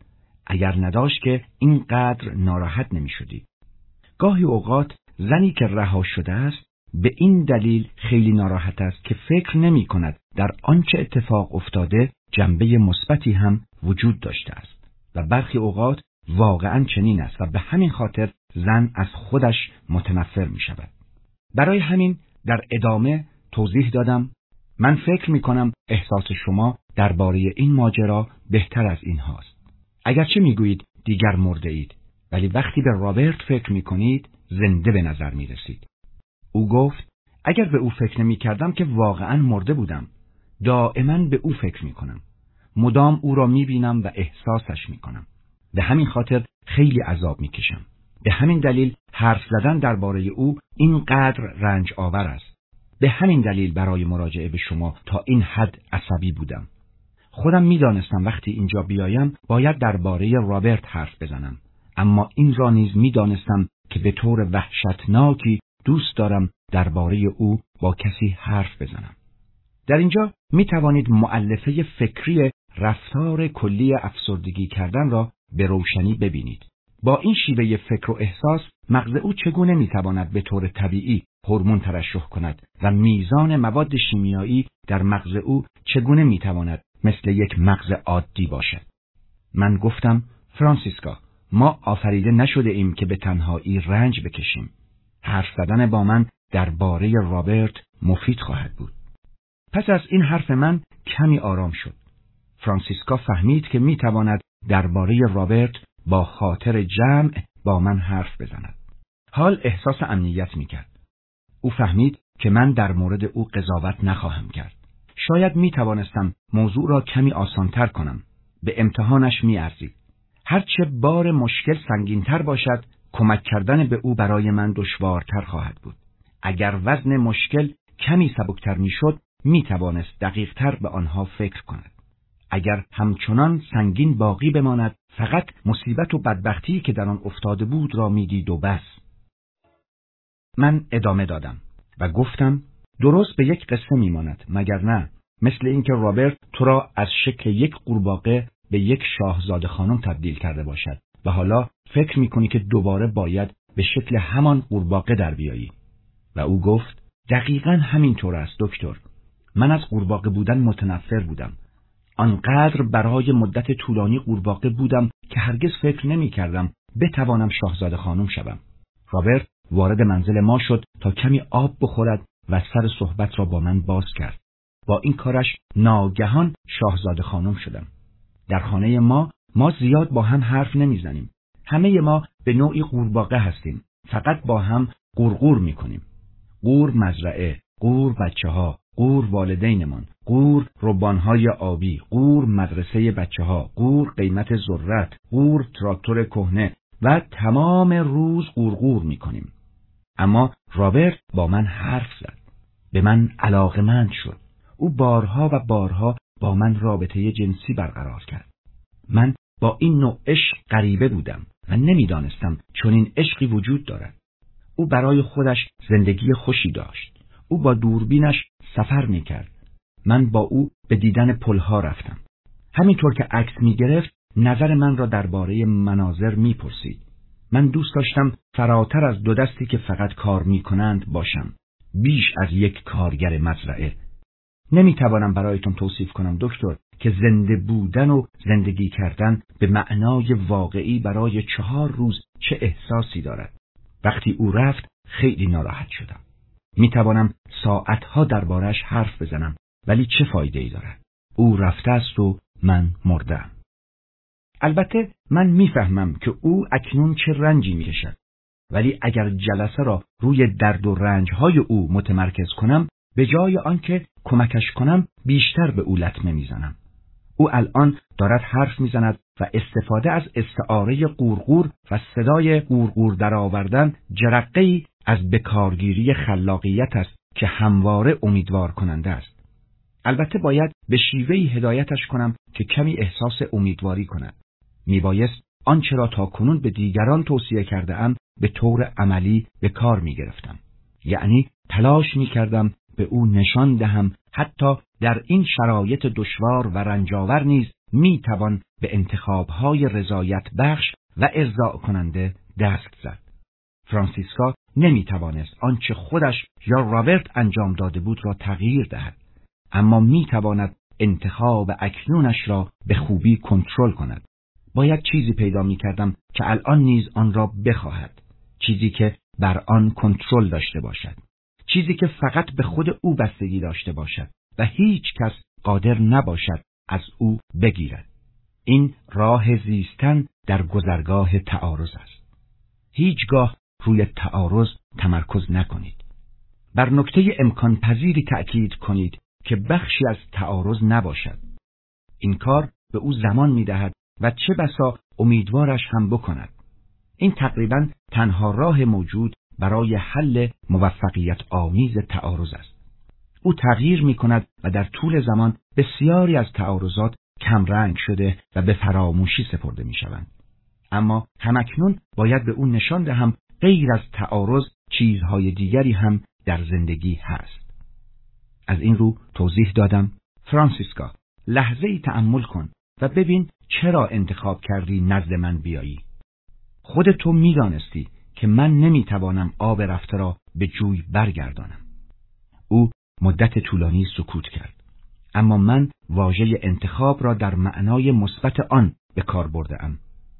اگر نداشت که اینقدر ناراحت نمی شدی. گاهی اوقات زنی که رها شده است به این دلیل خیلی ناراحت است که فکر نمی کند در آنچه اتفاق افتاده جنبه مثبتی هم وجود داشته است و برخی اوقات واقعاً چنین است و به همین خاطر زن از خودش متنفر می شود. برای همین در ادامه توضیح دادم من فکر می کنم احساس شما درباره این ماجرا بهتر از این هاست. اگرچه می گویید دیگر مرده اید، ولی وقتی به رابرت فکر می کنید زنده به نظر می رسید. او گفت اگر به او فکر نمی کردم که واقعاً مرده بودم. دائما به او فکر می کنم. مدام او را می بینم و احساسش می کنم. به همین خاطر خیلی عذاب می کشم. به همین دلیل حرف زدن درباره او اینقدر رنج آور است. به همین دلیل برای مراجعه به شما تا این حد عصبی بودم. خودم می دانستم وقتی اینجا بیایم باید درباره رابرت حرف بزنم. اما این را نیز می دانستم که به طور وحشتناکی دوست دارم درباره او با کسی حرف بزنم. در اینجا می توانید مؤلفه فکری رفتار کلی افسردگی کردن را به روشنی ببینید. با این شیوه فکر و احساس مغز او چگونه می تواند به طور طبیعی هورمون ترشح کند و میزان مواد شیمیایی در مغز او چگونه می تواند مثل یک مغز عادی باشد. من گفتم فرانسیسکا، ما آفریده نشده ایم که به تنهایی رنج بکشیم. حرف زدن با من درباره رابرت مفید خواهد بود. پس از این حرف من کمی آرام شد. فرانسیسکا فهمید که می تواند درباره رابرت با خاطر جمع با من حرف بزند. حال احساس امنیت می کرد. او فهمید که من در مورد او قضاوت نخواهم کرد. شاید می توانستم موضوع را کمی آسانتر کنم. به امتحانش می ارزید. هرچه بار مشکل سنگینتر باشد، کمک کردن به او برای من دشوارتر خواهد بود. اگر وزن مشکل کمی سبکتر می شد، می توانست دقیقتر به آنها فکر کند. اگر همچنان سنگین باقی بماند، فقط مصیبت و بدبختی که در آن افتاده بود را می دید و بس. من ادامه دادم و گفتم درست به یک قصه می ماند، مگر نه؟ مثل اینکه رابرت تو را از شکل یک قورباغه به یک شاهزاده خانم تبدیل کرده باشد و حالا فکر می کنی که دوباره باید به شکل همان قورباغه در بیایی. و او گفت دقیقاً همین طور است دکتر. من از قورباغه بودن متنفر بودم. آنقدر برای مدت طولانی قورباغه بودم که هرگز فکر نمی کردم بتوانم شاهزاده خانم شوم. رابرت وارد منزل ما شد تا کمی آب بخورد و سر صحبت را با من باز کرد. با این کارش ناگهان شاهزاده خانم شدم. در خانه ما ما زیاد با هم حرف نمیزنیم. همه ما به نوعی قورباغه هستیم. فقط با هم قورقور میکنیم. قور مزرعه، قور بچه ها، قور والدینمان، قور ربانهای آبی، قور مدرسه بچه ها، قور قیمت ذرت، قور تراکتور کهنه و تمام روز قورقور میکنیم. اما رابرت با من حرف زد. به من علاقه‌مند شد. او بارها و بارها با من رابطه جنسی برقرار کرد. من با این نوع عشق غریبه بودم و نمیدانستم چنین عشقی وجود دارد. او برای خودش زندگی خوشی داشت. او با دوربینش سفر میکرد. من با او به دیدن پلها رفتم. همینطور که عکس میگرفت نظر من را درباره مناظر میپرسید. من دوست داشتم فراتر از دو دستی که فقط کار میکنند باشم. بیش از یک کارگر مزرعه. نمیتوانم برایتون توصیف کنم دکتر که زنده بودن و زندگی کردن به معنای واقعی برای چهار روز چه احساسی دارد. وقتی او رفت خیلی ناراحت شدم. میتوانم ساعتها دربارش حرف بزنم ولی چه فایده ای دارد؟ او رفته است و من مردم. البته من میفهمم که او اکنون چه رنجی میکشد. ولی اگر جلسه را روی درد و رنجهای او متمرکز کنم، به جای آنکه کمکش کنم بیشتر به او لطمه میزنم. او الان دارد حرف میزند و استفاده از استعاره قورقور و صدای قورقور درآوردن جرقه‌ای از بکارگیری خلاقیت است که همواره امیدوار کننده است. البته باید به شیوهی هدایتش کنم که کمی احساس امیدواری کند. میبایست آنچه را تا کنون به دیگران توصیه کرده ام به طور عملی به کار میگرفتم. یعنی تلاش میکردم به او نشان دهم حتی در این شرایط دشوار و رنجاور نیز می توان به انتخاب‌های رضایت بخش و ارضاء کننده دست زد. فرانسیسکا نمی توانست آنچه خودش یا رابرت انجام داده بود را تغییر دهد، اما می تواند انتخاب اکنونش را به خوبی کنترل کند. باید چیزی پیدا می کردم که الان نیز آن را بخواهد، چیزی که بر آن کنترل داشته باشد، چیزی که فقط به خود او بستگی داشته باشد و هیچ کس قادر نباشد از او بگیرد. این راه زیستن در گذرگاه تعارض است. هیچگاه روی تعارض تمرکز نکنید. بر نکته امکان پذیری تأکید کنید که بخشی از تعارض نباشد. این کار به او زمان می‌دهد و چه بسا امیدوارش هم بکند. این تقریباً تنها راه موجود برای حل موفقیت آمیز تعارض است. او تغییر می‌کند و در طول زمان بسیاری از تعارضات کمرنگ شده و به فراموشی سپرده می‌شوند. اما همکنون باید به او نشان دهم غیر از تعارض چیزهای دیگری هم در زندگی هست. از این رو توضیح دادم: فرانسیسکا، لحظه‌ای تأمل کن و ببین چرا انتخاب کردی نزد من بیایی. خود تو می‌دانستی که من نمی‌توانم آب رفته را به جوی برگردانم. او مدت طولانی سکوت کرد، اما من واژه انتخاب را در معنای مثبت آن به کار برده‌ام.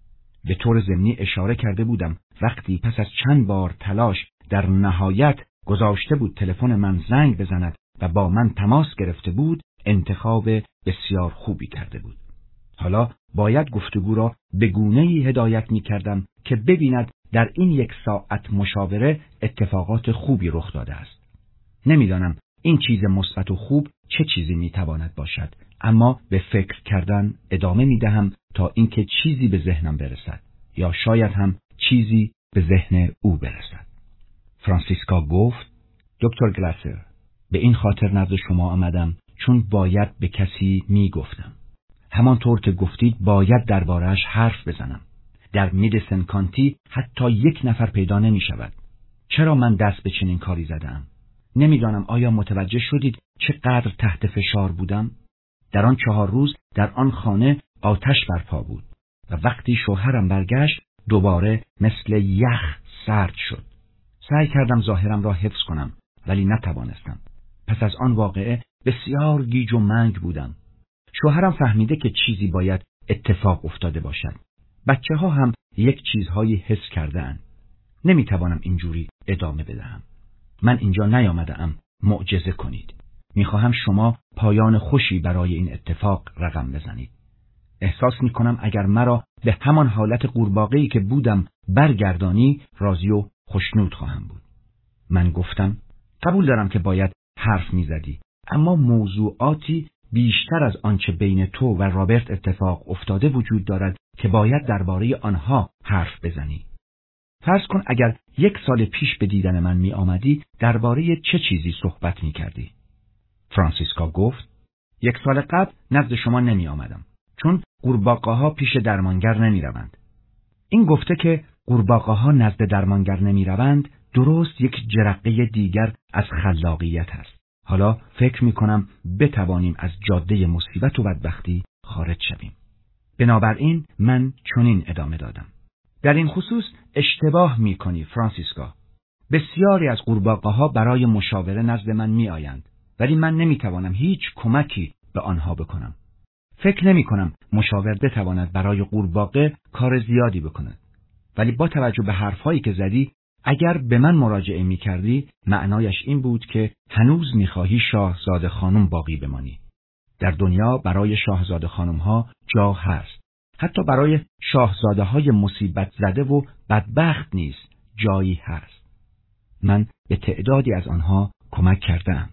به طور ضمنی اشاره کرده بودم وقتی پس از چند بار تلاش در نهایت گذاشته بود تلفن من زنگ بزند و با من تماس گرفته بود، انتخاب بسیار خوبی کرده بود. حالا باید گفتگو را به گونه‌ای هدایت می کردم که ببیند در این یک ساعت مشاوره اتفاقات خوبی رخ داده است. نمیدانم این چیز مثبت و خوب چه چیزی می تواند باشد، اما به فکر کردن ادامه می دهم تا اینکه چیزی به ذهنم برسد، یا شاید هم چیزی به ذهن او برسد. فرانسیسکا گفت: دکتر گلاسر، به این خاطر نزد شما آمدم چون باید به کسی می گفتم. همانطور که گفتید باید درباره‌اش حرف بزنم. در میدیسن کانتی حتی یک نفر پیدا نمی شود. چرا من دست به چنین کاری زدم؟ نمیدانم آیا متوجه شدید چقدر تحت فشار بودم؟ در آن چهار روز در آن خانه آتش برپا بود و وقتی شوهرم برگشت دوباره مثل یخ سرد شد. سعی کردم ظاهرم را حفظ کنم ولی نتوانستم. پس از آن واقعه بسیار گیج و منگ بودم. شوهرم فهمیده که چیزی باید اتفاق افتاده باشد. بچه ها هم یک چیزهایی حس کرده‌اند. نمیتوانم اینجوری ادامه بدهم. من اینجا نیامده‌ام معجزه کنید. میخواهم شما پایان خوشی برای این اتفاق رقم بزنید. احساس میکنم اگر مرا به همان حالت قورباغه‌ای که بودم برگردانی، راضی و خوشنود خواهم بود. من گفتم: قبول دارم که باید حرف میزدی، اما موضوعاتی بیشتر از آنچه بین تو و رابرت اتفاق افتاده وجود دارد که باید درباره آنها حرف بزنی. فرض کن اگر یک سال پیش به دیدن من می آمدی، درباره چه چیزی صحبت می کردی؟ فرانسیسکا گفت: یک سال قبل نزد شما نمی آمدم، چون قورباغه‌ها پیش درمانگر نمی روند. این گفته که قورباغه‌ها نزد درمانگر نمی روند، درست یک جرقه دیگر از خلاقیت است. حالا فکر می کنم بتوانیم از جاده مصیبت و بدبختی خارج شویم. بنابراین من چنین ادامه دادم: در این خصوص اشتباه می کنی فرانسیسکا. بسیاری از قورباغه‌ها برای مشاوره نزد من می آیند، ولی من نمی توانم هیچ کمکی به آنها بکنم. فکر نمی کنم مشاور بتواند برای قورباغه کار زیادی بکند. ولی با توجه به حرفهایی که زدی، اگر به من مراجعه می کردی، معنایش این بود که هنوز می خواهی شاهزاده خانم باقی بمانی. در دنیا برای شاهزاده خانم ها جا هست. حتی برای شاهزاده های مصیبت زده و بدبخت نیز جایی هست. من به تعدادی از آنها کمک کردم.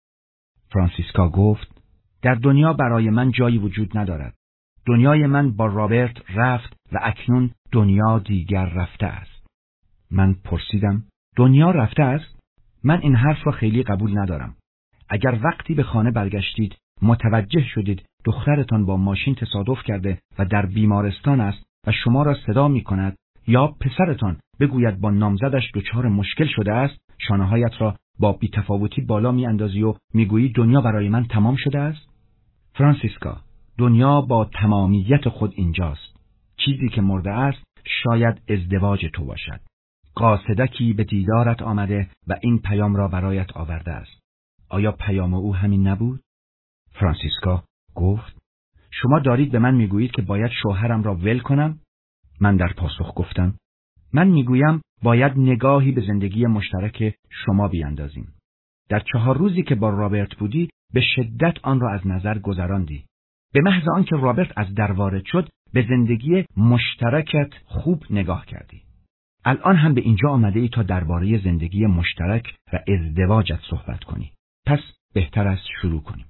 فرانسیسکا گفت: در دنیا برای من جایی وجود ندارد. دنیای من با رابرت رفت و اکنون دنیا دیگر رفته است. من پرسیدم: دنیا رفته است؟ من این حرف را خیلی قبول ندارم. اگر وقتی به خانه برگشتید متوجه شدید دخترتان با ماشین تصادف کرده و در بیمارستان است و شما را صدا می کند، یا پسرتان بگوید با نامزدش دچار مشکل شده است، شانه‌هایت را با بی‌تفاوتی بالا می اندازی و می گویی دنیا برای من تمام شده است؟ فرانسیسکا، دنیا با تمامیت خود اینجاست. چیزی که مرده است شاید ازدواج تو باشد. قاصدکی به دیدارت آمده و این پیام را برایت آورده است. آیا پیام او همین نبود؟ فرانسیسکا گفت: شما دارید به من میگویید که باید شوهرم را ول کنم؟ من در پاسخ گفتم: من میگویم باید نگاهی به زندگی مشترک شما بیاندازیم. در چهار روزی که با رابرت بودی به شدت آن را از نظر گذراندی. به محض آنکه رابرت از در وارد شد به زندگی مشترکت خوب نگاه کردی. الان هم به اینجا آمده ای تا درباره زندگی مشترک و ازدواجت صحبت کنی. پس بهتر است شروع کنیم.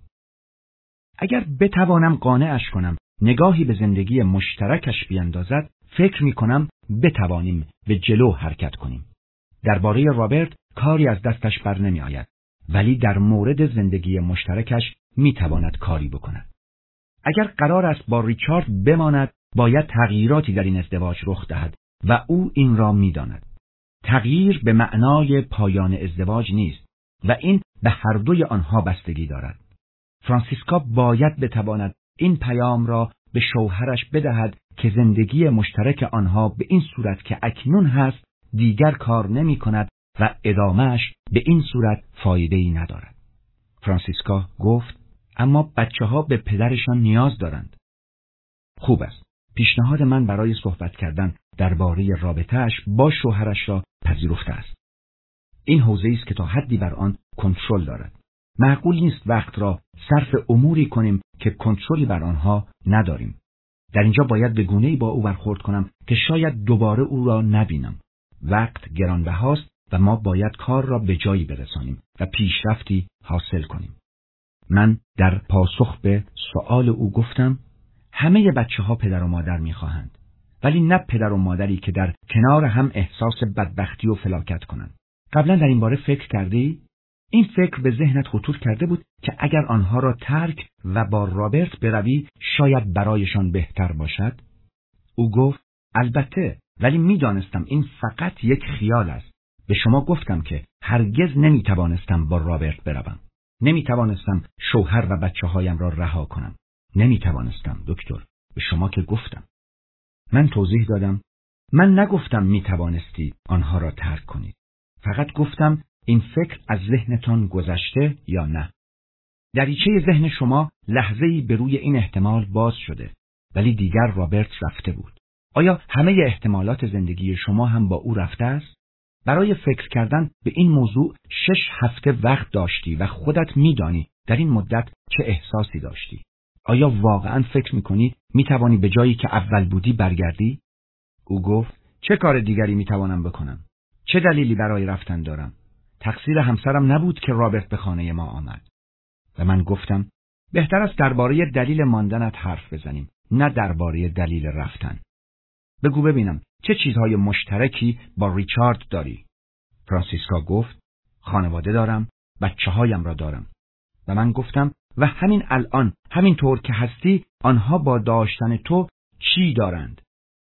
اگر بتوانم قانعش کنم نگاهی به زندگی مشترکش بیاندازد، فکر می کنم بتوانیم به جلو حرکت کنیم. درباره رابرت کاری از دستش بر نمی آید، ولی در مورد زندگی مشترکش می تواند کاری بکند. اگر قرار است با ریچارد بماند، باید تغییراتی در این ازدواج رخ دهد و او این را می داند. تغییر به معنای پایان ازدواج نیست و این به هر دوی آنها بستگی دارد. فرانسیسکا باید بتواند این پیام را به شوهرش بدهد که زندگی مشترک آنها به این صورت که اکنون هست دیگر کار نمی کند و ادامهش به این صورت فایده‌ای ندارد. فرانسیسکا گفت: اما بچه ها به پدرشان نیاز دارند. خوب است. پیشنهاد من برای صحبت کردن درباره رابطه‌اش با شوهرش را پذیرفته است. این حوزه‌ای است که تا حدی بر آن کنترل دارد. معقول نیست وقت را صرف اموری کنیم که کنترلی بر آنها نداریم. در اینجا باید به گونه‌ای با او برخورد کنم که شاید دوباره او را نبینم. وقت گرانبهاست و ما باید کار را به جایی برسانیم و پیشرفتی حاصل کنیم. من در پاسخ به سؤال او گفتم: همه بچه ها پدر و مادر می‌خواهند، ولی نه پدر و مادری که در کنار هم احساس بدبختی و فلاکت کنند. قبلا در این باره فکر کردی؟ این فکر به ذهنت خطور کرده بود که اگر آنها را ترک و با رابرت بروی شاید برایشان بهتر باشد؟ او گفت: البته، ولی می‌دانستم این فقط یک خیال است. به شما گفتم که هرگز نمی‌توانستم با رابرت بروم. نمی‌توانستم شوهر و بچه‌هایم را رها کنم. نمی‌توانستم دکتر. به شما که گفتم. من توضیح دادم: من نگفتم می‌توانستی آنها را ترک کنید. فقط گفتم این فکر از ذهنتان گذشته یا نه. دریچه ذهن شما لحظه‌ای به روی این احتمال باز شده، ولی دیگر رابرت رفته بود. آیا همه احتمالات زندگی شما هم با او رفته است؟ برای فکر کردن به این موضوع شش هفته وقت داشتی و خودت می‌دانی در این مدت چه احساسی داشتی. آیا واقعاً فکر می‌کنی می‌توانی به جایی که اول بودی برگردی؟ او گفت: چه کار دیگری می‌توانم بکنم؟ چه دلیلی برای رفتن دارم؟ تقصیر همسرم نبود که رابرت به خانه ما آمد. و من گفتم: بهتر است درباره دلیل ماندنت حرف بزنیم، نه درباره دلیل رفتن. بگو ببینم چه چیزهای مشترکی با ریچارد داری؟ فرانسیسکا گفت: خانواده دارم، بچه هایم را دارم. و من گفتم: و همین الان، همین طور که هستی، آنها با داشتن تو چی دارند؟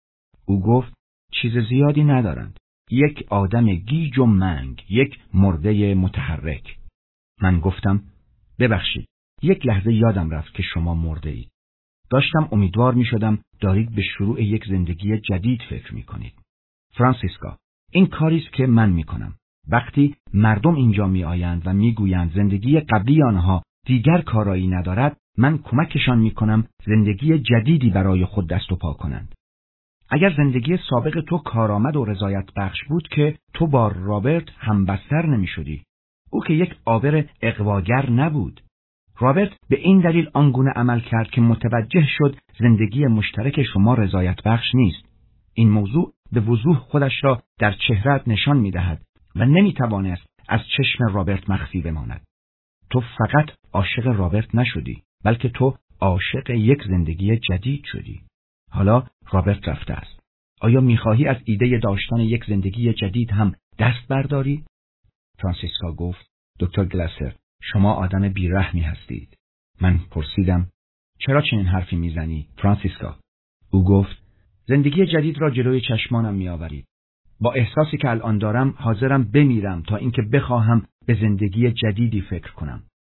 او گفت: چیز زیادی ندارند. یک آدم گیج و منگ، یک مرده متحرک. من گفتم: ببخشید، یک لحظه یادم رفت که شما مرده اید. داشتم امیدوار می شدم دارید به شروع یک زندگی جدید فکر می کنید. فرانسیسکا، این کاری است که من می کنم. وقتی مردم اینجا می آیند و می گویند زندگی قبلی آنها دیگر کارایی ندارد، من کمکشان می کنم زندگی جدیدی برای خود دست و پا کنند. اگر زندگی سابق تو کارآمد و رضایت بخش بود که تو با رابرت همبستر نمی شدی. او که یک عابر اغواگر نبود. رابرت به این دلیل آنگونه عمل کرد که متوجه شد زندگی مشترک شما رضایت بخش نیست. این موضوع به وضوح خودش را در چهره‌ات نشان می دهد و نمی توانست از چشم رابرت مخفی بماند. تو فقط عاشق رابرت نشدی، بلکه تو عاشق یک زندگی جدید شدی. حالا رابرت رفته است. آیا می‌خواهی از ایده داشتن یک زندگی جدید هم دست برداری؟ فرانسیسکا گفت: دکتر گلاسر، شما آدم بی‌رحمی هستید. من پرسیدم: چرا چنین حرفی میزنی فرانسیسکا؟ او گفت: زندگی جدید را جلوی چشمانم میآورید. با احساسی که الان دارم حاضرم بمیرم تا اینکه بخواهم به زندگی جدیدی فکر کنم.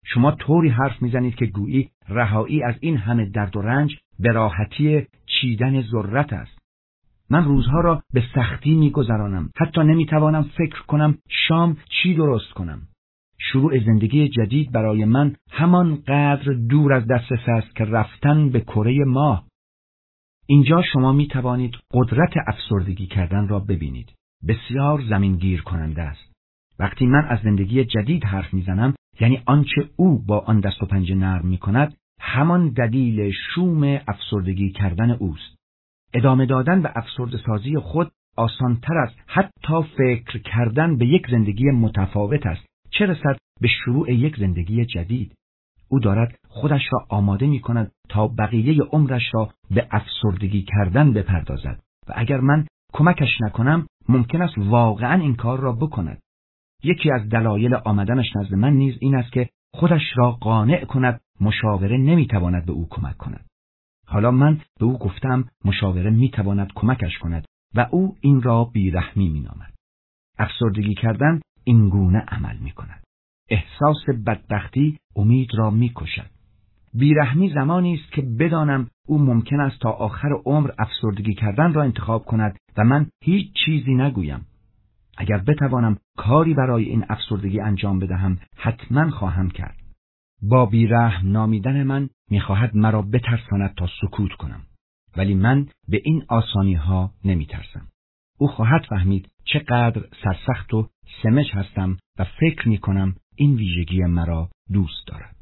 شما طوری حرف میزنید که گویی رهایی از این همه درد و رنج به راحتی چیدن ذرت است. من روزها را به سختی میگذرانم. حتی نمیتوانم فکر کنم شام چی درست کنم. شروع زندگی جدید برای من همان قدر دور از دسترس است که رفتن به کره ماه. اینجا شما میتوانید قدرت افسردگی کردن را ببینید. بسیار زمینگیر کننده است. وقتی من از زندگی جدید حرف میزنم، یعنی آنچه او با آن دست و پنجه نرم میکند، همان دلیل شوم افسردگی کردن اوست. ادامه دادن به افسرده سازی خود آسانتر است حتی فکر کردن به یک زندگی متفاوت است، چه رسد به شروع یک زندگی جدید. او دارد خودش را آماده می کند تا بقیه عمرش را به افسردگی کردن بپردازد و اگر من کمکش نکنم ممکن است واقعا این کار را بکند. یکی از دلایل آمدنش نزد من نیز این است که خودش را قانع کند مشاوره نمی تواند به او کمک کند. حالا من به او گفتم مشاوره می تواند کمکش کند و او این را بیرحمی می نامد. افسردگی کردن این گونه عمل می کند. احساس بدبختی امید را می کشد. بیرحمی زمانی است که بدانم او ممکن است تا آخر عمر افسردگی کردن را انتخاب کند و من هیچ چیزی نگویم. اگر بتوانم کاری برای این افسردگی انجام بدهم حتما خواهم کرد. با بیرحم نامیدن من میخواهد مرا بترساند تا سکوت کنم، ولی من به این آسانی ها نمی ترسم. او خواهد فهمید چقدر سرسخت و سمج هستم و فکر می کنم این ویژگی مرا دوست دارد.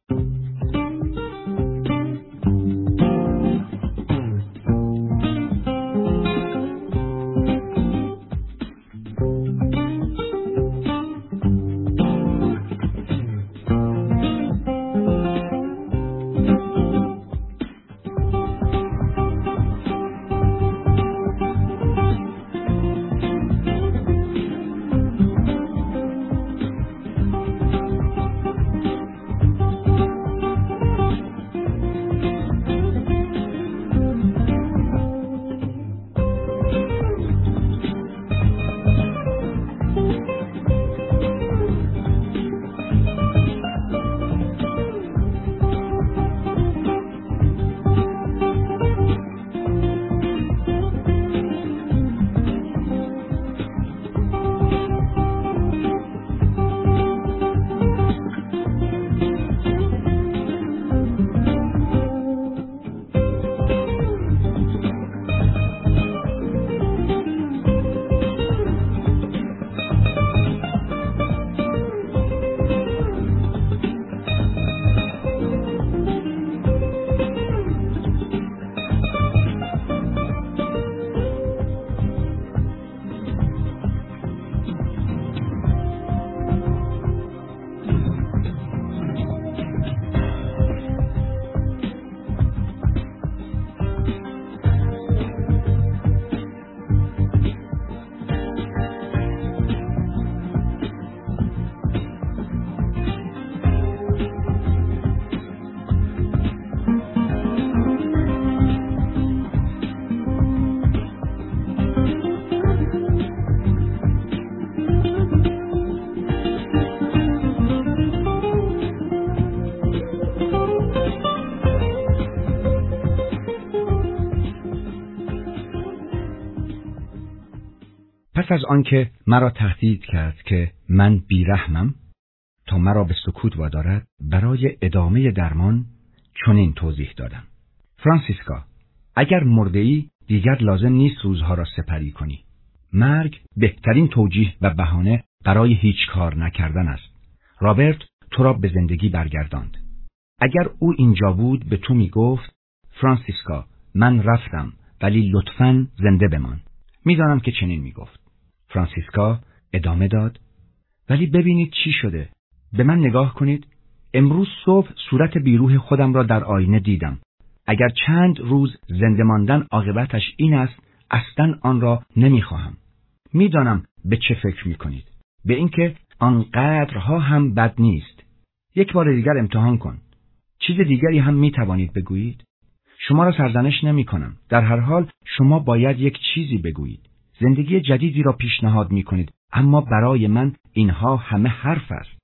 پس از آنکه مرا تهدید کرد که من بیرحمم تا مرا به سکوت وادارد، برای ادامه درمان چنین توضیح دادم: فرانسیسکا، اگر مرده‌ای دیگر لازم نیست روزها را سپری کنی. مرگ بهترین توجیه و بهانه برای هیچ کار نکردن است. رابرت تو را به زندگی برگرداند. اگر او اینجا بود به تو می گفت: فرانسیسکا، من رفتم ولی لطفاً زنده بمان. میدانم که چنین می گفت. فرانسیسکا ادامه داد: ولی ببینید چی شده. به من نگاه کنید. امروز صبح صورت بیروح خودم را در آینه دیدم. اگر چند روز زنده ماندن عاقبتش این است، اصلاً آن را نمیخواهم. میدانم به چه فکر میکنید. به اینکه آنقدرها هم بد نیست. یک بار دیگر امتحان کن. چیز دیگری هم میتوانید بگویید. شما را سرزنش نمی کنم. در هر حال شما باید یک چیزی بگویید. زندگی جدیدی را پیشنهاد می کنید، اما برای من اینها همه حرف است.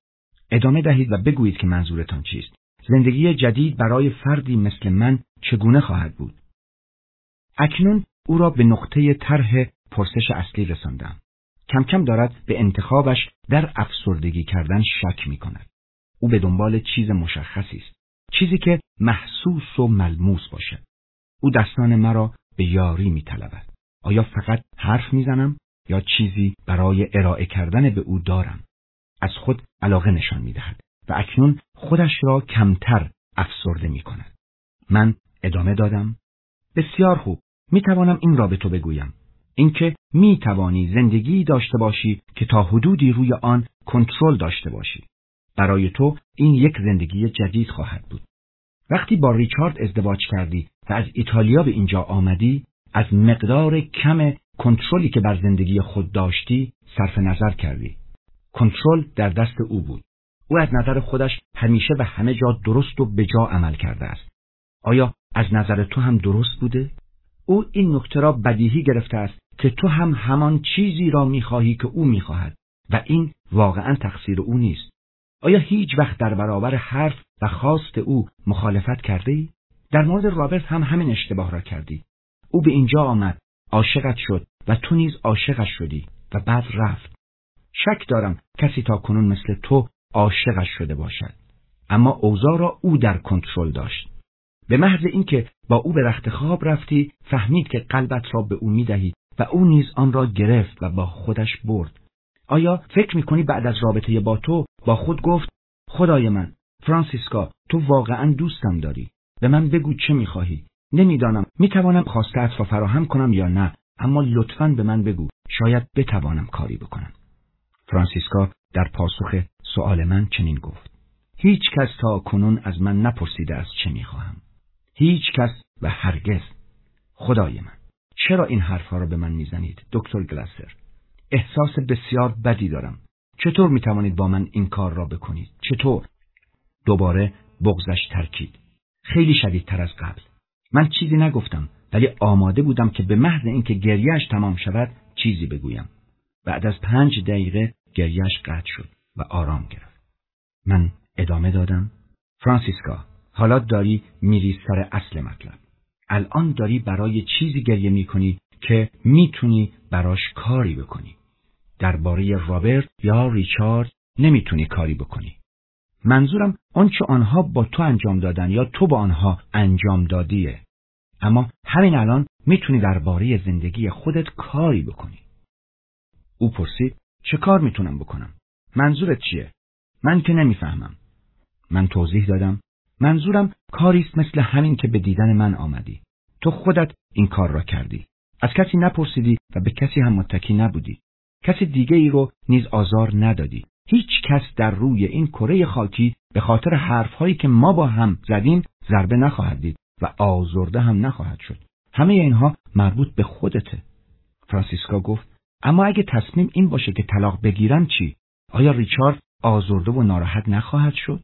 ادامه دهید و بگویید که منظورتان چیست. زندگی جدید برای فردی مثل من چگونه خواهد بود؟ اکنون او را به نقطه طرح پرسش اصلی رساندم. کم کم دارد به انتخابش در افسردگی کردن شک می کند. او به دنبال چیز مشخصی است. چیزی که محسوس و ملموس باشد. او دستان مرا به یاری می طلبد. آیا فقط حرف می زنم یا چیزی برای ارائه کردن به او دارم؟ از خود علاقه نشان می دهد و اکنون خودش را کمتر افسرده می کند. من ادامه دادم. بسیار خوب. می توانم این را به تو بگویم. اینکه می توانی زندگی داشته باشی که تا حدودی روی آن کنترل داشته باشی. برای تو این یک زندگی جدید خواهد بود. وقتی با ریچارد ازدواج کردی و از ایتالیا به اینجا آمدی، از مقدار کم کنترلی که بر زندگی خود داشتی صرف نظر کردی. کنترل در دست او بود. او از نظر خودش همیشه و همه جا درست و به جا عمل کرده است. آیا از نظر تو هم درست بوده؟ او این نکته را بدیهی گرفته است که تو هم همان چیزی را می‌خواهی که او می‌خواهد و این واقعاً تقصیر او نیست. آیا هیچ وقت در برابر حرف و خواست او مخالفت کردی؟ در مورد رابرت هم همین اشتباه را کردی. او به اینجا آمد، عاشقت شد و تو نیز عاشقش شدی و بعد رفت. شک دارم کسی تا کنون مثل تو عاشقش شده باشد. اما اوضاع را او در کنترل داشت. به محض اینکه با او به رخت خواب رفتی، فهمید که قلبت را به او می‌دهی و او نیز آن را گرفت و با خودش برد. آیا فکر می‌کنی بعد از رابطه با تو با خود گفت خدای من، فرانسیسکا، تو واقعاً دوستم داری؟ به من بگو چه می‌خواهی؟ نمی‌دانم می‌توانم خواسته‌ات را فراهم کنم یا نه، اما لطفاً به من بگو، شاید بتوانم کاری بکنم. فرانسیسکا در پاسخ سؤال من چنین گفت: هیچ کس تا کنون از من نپرسیده است چه می‌خواهم. هیچ کس و هرگز. خدای من، چرا این حرفها را به من می‌زنید دکتر گلاسر؟ احساس بسیار بدی دارم. چطور می‌توانید با من این کار را بکنید؟ چطور؟ دوباره بغضش ترکید. خیلی شدیدتر از قبل. من چیزی نگفتم، ولی آماده بودم که به محض اینکه گریه‌اش تمام شود چیزی بگویم. بعد از پنج دقیقه گریه‌اش قطع شد و آرام گرفت. من ادامه دادم: فرانسیسکا، حالا داری میری سر اصل مطلب. الان داری برای چیزی گریه میکنی که میتونی براش کاری بکنی. درباره رابرت یا ریچارد نمیتونی کاری بکنی. منظورم آنچه آنها با تو انجام دادن یا تو با آنها انجام دادیه. اما همین الان میتونی درباره زندگی خودت کاری بکنی. او پرسید: چه کار میتونم بکنم؟ منظورت چیه؟ من که نمیفهمم. من توضیح دادم: منظورم کاریست مثل همین که به دیدن من آمدی. تو خودت این کار را کردی. از کسی نپرسیدی و به کسی هم متکی نبودی. کسی دیگه ای رو نیز آزار ندادی. هیچ کس در روی این کره خاکی به خاطر حرفهایی که ما با هم زدیم ضربه نخواهد دید و آزرده هم نخواهد شد. همه اینها مربوط به خودته. فرانسیسکا گفت: اما اگه تصمیم این باشه که طلاق بگیرم چی؟ آیا ریچارد آزرده و ناراحت نخواهد شد؟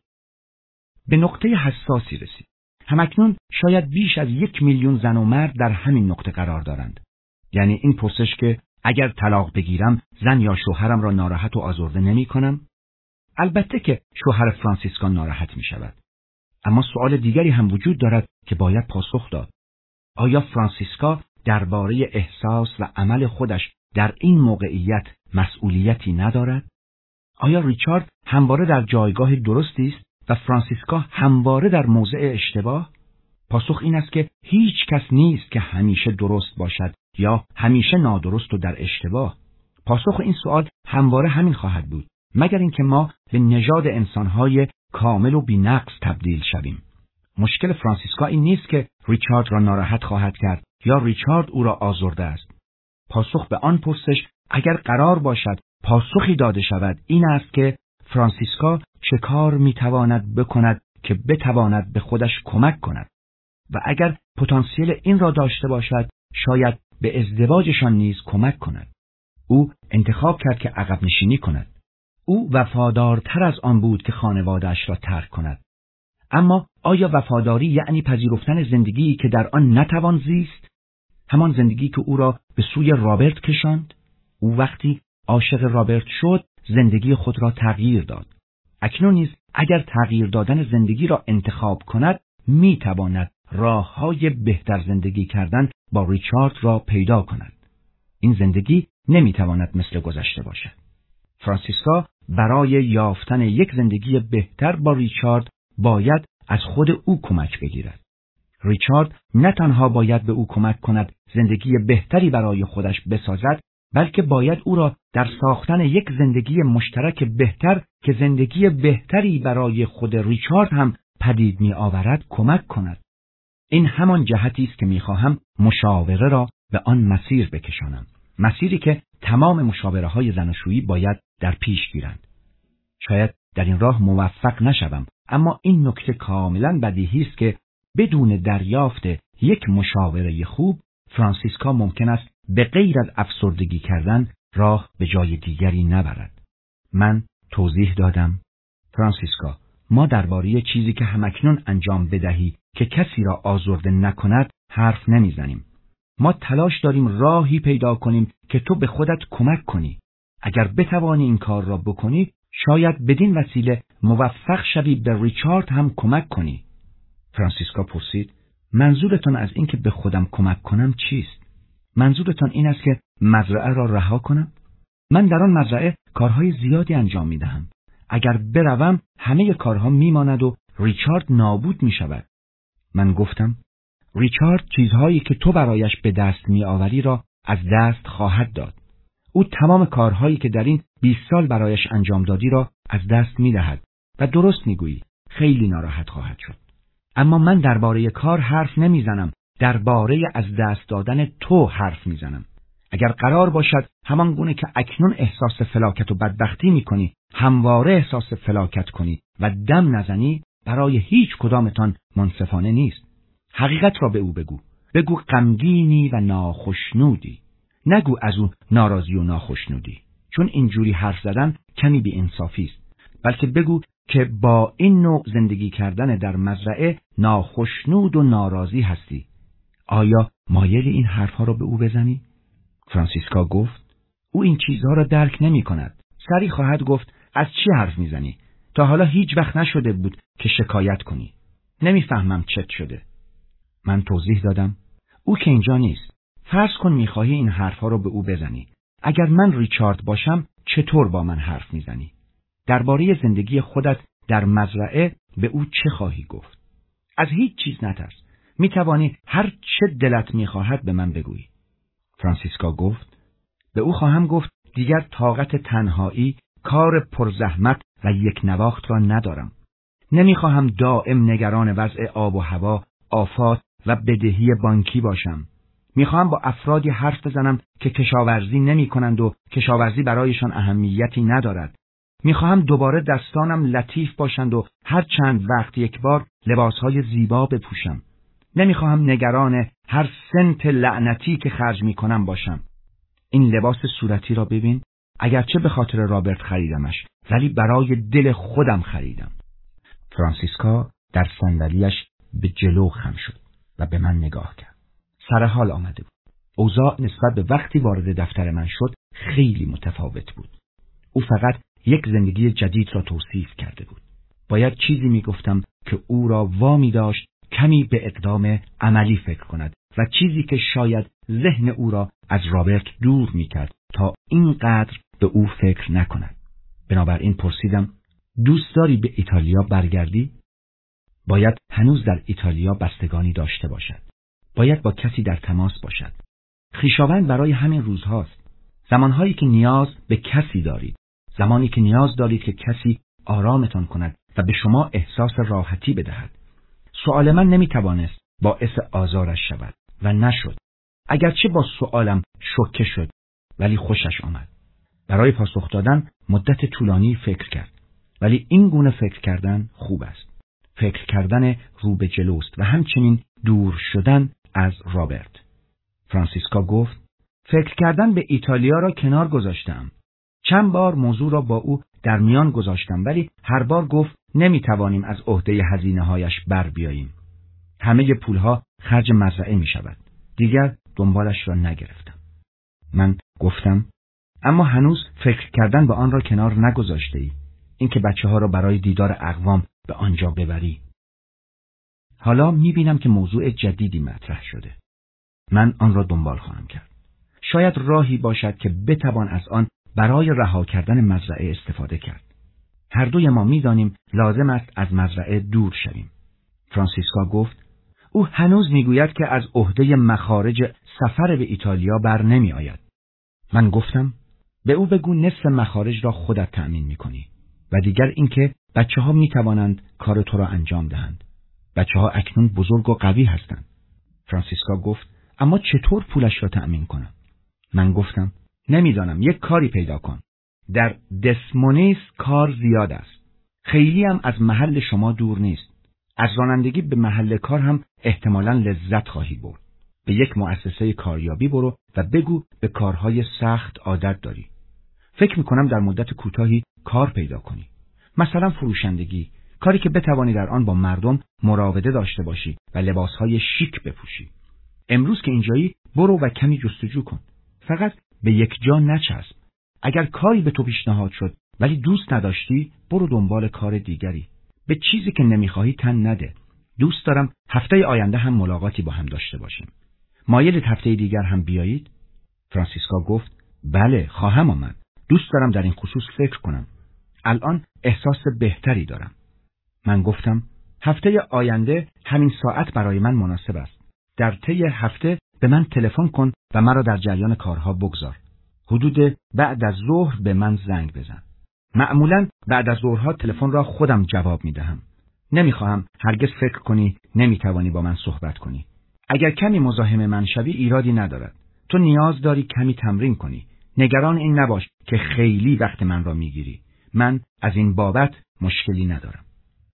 به نقطه حساسی رسید. همکنون شاید بیش از یک میلیون زن و مرد در همین نقطه قرار دارند. یعنی این پرسش که اگر طلاق بگیرم زن یا شوهرم را ناراحت و آزرده نمی کنم؟ البته که شوهر فرانسیسکا ناراحت می شود. اما سوال دیگری هم وجود دارد که باید پاسخ داد. آیا فرانسیسکا درباره احساس و عمل خودش در این موقعیت مسئولیتی ندارد؟ آیا ریچارد همواره در جایگاه درستی است و فرانسیسکا همواره در موضع اشتباه؟ پاسخ این است که هیچ کس نیست که همیشه درست باشد یا همیشه نادرست و در اشتباه. پاسخ این سوال همواره همین خواهد بود، مگر اینکه ما به نژاد انسانهای کامل و بی‌نقص تبدیل شویم. مشکل فرانسیسکا این نیست که ریچارد را ناراحت خواهد کرد یا ریچارد او را آزرده است. پاسخ به آن پرسش اگر قرار باشد پاسخی داده شود این است که فرانسیسکا چه کار میتواند بکند که بتواند به خودش کمک کند و اگر پتانسیل این را داشته باشد شاید به ازدواجشان نیز کمک کند. او انتخاب کرد که عقب نشینی کند. او وفادارتر از آن بود که خانواده‌اش را ترک کند. اما آیا وفاداری یعنی پذیرفتن زندگی که در آن نتوان زیست؟ همان زندگی که او را به سوی رابرت کشاند؟ او وقتی عاشق رابرت شد زندگی خود را تغییر داد. اکنون نیز اگر تغییر دادن زندگی را انتخاب کند، می تواند راه‌های بهتر زندگی کردن با ریچارد را پیدا کند. این زندگی نمی تواند مثل گذشته باشد. فرانسیسکا برای یافتن یک زندگی بهتر با ریچارد باید از خود او کمک بگیرد. ریچارد نه تنها باید به او کمک کند زندگی بهتری برای خودش بسازد، بلکه باید او را در ساختن یک زندگی مشترک بهتر که زندگی بهتری برای خود ریچارد هم پدید می آورد کمک کند. این همان جهتی است که می خواهم مشاوره را به آن مسیر بکشانم. مسیری که تمام مشاوره های زناشویی باید در پیش گیرند. شاید در این راه موفق نشوم، اما این نکته کاملا بدیهی است که بدون دریافت یک مشاوره خوب، فرانسیسکا ممکن است به غیر از افسردگی کردن راه به جای دیگری نبرد. من توضیح دادم: فرانسیسکا، ما درباره چیزی که همکنون انجام بدهی که کسی را آزرده نکند حرف نمیزنیم. ما تلاش داریم راهی پیدا کنیم که تو به خودت کمک کنی. اگر بتوانی این کار را بکنی، شاید بدین وسیله موفق شوی به ریچارد هم کمک کنی. فرانسیسکا پرسید: منظورتان از این که به خودم کمک کنم چیست؟ منظورتان این است که مزرعه را رها کنم؟ من در آن مزرعه کارهای زیادی انجام می دهم. اگر بروم همه کارها می ماند و ریچارد نابود می شود. من گفتم: ریچارد چیزهایی که تو برایش به دست می آوری را از دست خواهد داد. او تمام کارهایی که در این بیست سال برایش انجام دادی را از دست می دهد و درست می گویی، خیلی ناراحت خواهد شد. اما من درباره کار حرف نمی زنم، درباره از دست دادن تو حرف می زنم. اگر قرار باشد همان گونه که اکنون احساس فلاکت و بدبختی می کنی، همواره احساس فلاکت کنی و دم نزنی، برای هیچ کدامتان منصفانه نیست. حقیقت را به او بگو. بگو غمگینی و ناخشنودی. نگو از او ناراضی و ناخشنودی، چون اینجوری حرف زدن کمی بی انصافی است. بلکه بگو که با این نوع زندگی کردن در مزرعه ناخشنود و ناراضی هستی. آیا مایل این حرفها را به او بزنی؟ فرانسیسکا گفت: او این چیزها را درک نمی کند. سری خواهد گفت: از چی حرف می زنی؟ تا حالا هیچ وقت نشده بود که شکایت کنی. نمیفهمم چت شده. من توضیح دادم: او که اینجا نیست. فرض کن میخواهی این حرفها رو به او بزنی. اگر من ریچارد باشم چطور با من حرف میزنی؟ درباره زندگی خودت در مزرعه به او چه خواهی گفت؟ از هیچ چیز نترس. میتوانی هر چه دلت میخواهد به من بگویی. فرانسیسکا گفت: به او خواهم گفت دیگر طاقت تنهایی، کار پرزحمت و یک نواخت را ندارم. نمیخواهم دائم نگران وضع آب و هوا، آفات و بدهی بانکی باشم. میخواهم با افرادی حرف بزنم که کشاورزی نمی کنند و کشاورزی برایشان اهمیتی ندارد. میخواهم دوباره دستانم لطیف باشند و هر چند وقت یک بار لباسهای زیبا بپوشم. نمیخواهم نگران هر سنت لعنتی که خرج میکنم باشم. این لباس صورتی را ببین، اگرچه به خاطر رابرت خریدمش، ولی برای دل خودم خریدم. فرانسیسکا در صندلیاش به جلو خم شد و به من نگاه کرد. سر حال آمده بود. اوضاع نسبت به وقتی وارد دفتر من شد خیلی متفاوت بود. او فقط یک زندگی جدید را توصیف کرده بود. باید چیزی می گفتم که او را وامی داشت کمی به اقدام عملی فکر کند و چیزی که شاید ذهن او را از رابرت دور می کرد تا اینقدر به او فکر نکند. بنابراین پرسیدم: دوست داری به ایتالیا برگردی؟ باید هنوز در ایتالیا بستگانی داشته باشد. باید با کسی در تماس باشد. خویشاوند برای همین روزهاست. زمانهایی که نیاز به کسی دارید. زمانی که نیاز دارید که کسی آرامتان کند و به شما احساس راحتی بدهد. سؤال من نمیتوانست باعث آزارش شود و نشد. اگرچه با سؤالم شوکه شد، ولی خوشش آمد. برای پاسخ دادن مدت طولانی فکر کرد. ولی این گونه فکر کردن خوب است. فکر کردن رو به جلوست و همچنین دور شدن از رابرت. فرانسیسکا گفت: فکر کردن به ایتالیا را کنار گذاشتم. چند بار موضوع را با او در میان گذاشتم، ولی هر بار گفت نمیتوانیم از عهده هزینه‌هایش بر بیاییم. همه پولها خرج مزرعه می شود. دیگر دنبالش را نگرفتم. من گفتم: اما هنوز فکر کردن به آن را کنار نگذاشته ای. اینکه بچه‌ها را برای دیدار اقوام به آنجا ببری. حالا می‌بینم که موضوع جدیدی مطرح شده. من آن را دنبال خواهم کرد. شاید راهی باشد که بتوان از آن برای رها کردن مزرعه استفاده کرد. هر دوی ما می‌دانیم لازم است از مزرعه دور شویم. فرانسیسکا گفت او هنوز میگوید که از عهده مخارج سفر به ایتالیا بر نمی آید. من گفتم به او بگو نصف مخارج را خودت تأمین میکنی و دیگر اینکه بچه ها می توانند کار تو را انجام دهند. بچه ها اکنون بزرگ و قوی هستند. فرانسیسکا گفت اما چطور پولش را تأمین کنم؟ من گفتم نمیدانم، یک کاری پیدا کن. در دسمونیس کار زیاد است. خیلی هم از محل شما دور نیست. از رانندگی به محل کار هم احتمالاً لذت خواهی برد. به یک مؤسسه کاریابی برو و بگو به کارهای سخت عادت داری. فکر میکنم در مدت کوتاهی کار پیدا کنی. مثلا فروشندگی، کاری که بتوانی در آن با مردم مراوده داشته باشی و لباسهای شیک بپوشی. امروز که اینجایی برو و کمی جستجو کن. فقط به یک جا نچسب. اگر کاری به تو پیشنهاد شد ولی دوست نداشتی، برو دنبال کار دیگری. به چیزی که نمیخواهی تن نده. دوست دارم هفته آینده هم ملاقاتی با هم داشته باشیم. مایلید هفته دیگر هم بیایید؟ فرانسیسکا گفت بله، خواهم آمد. دوست دارم در این خصوص فکر کنم. الان احساس بهتری دارم. من گفتم هفته آینده همین ساعت برای من مناسب است. در طی هفته به من تلفن کن و مرا در جریان کارها بگذار. حدود بعد از ظهر به من زنگ بزن. معمولاً بعد از ظهرها تلفن را خودم جواب می دهم. نمیخواهم هرگز فکر کنی نمیتوانی با من صحبت کنی. اگر کمی مزاحم من شوی ایرادی ندارد. تو نیاز داری کمی تمرین کنی. نگران این نباش که خیلی وقت من را میگیری. من از این بابت مشکلی ندارم.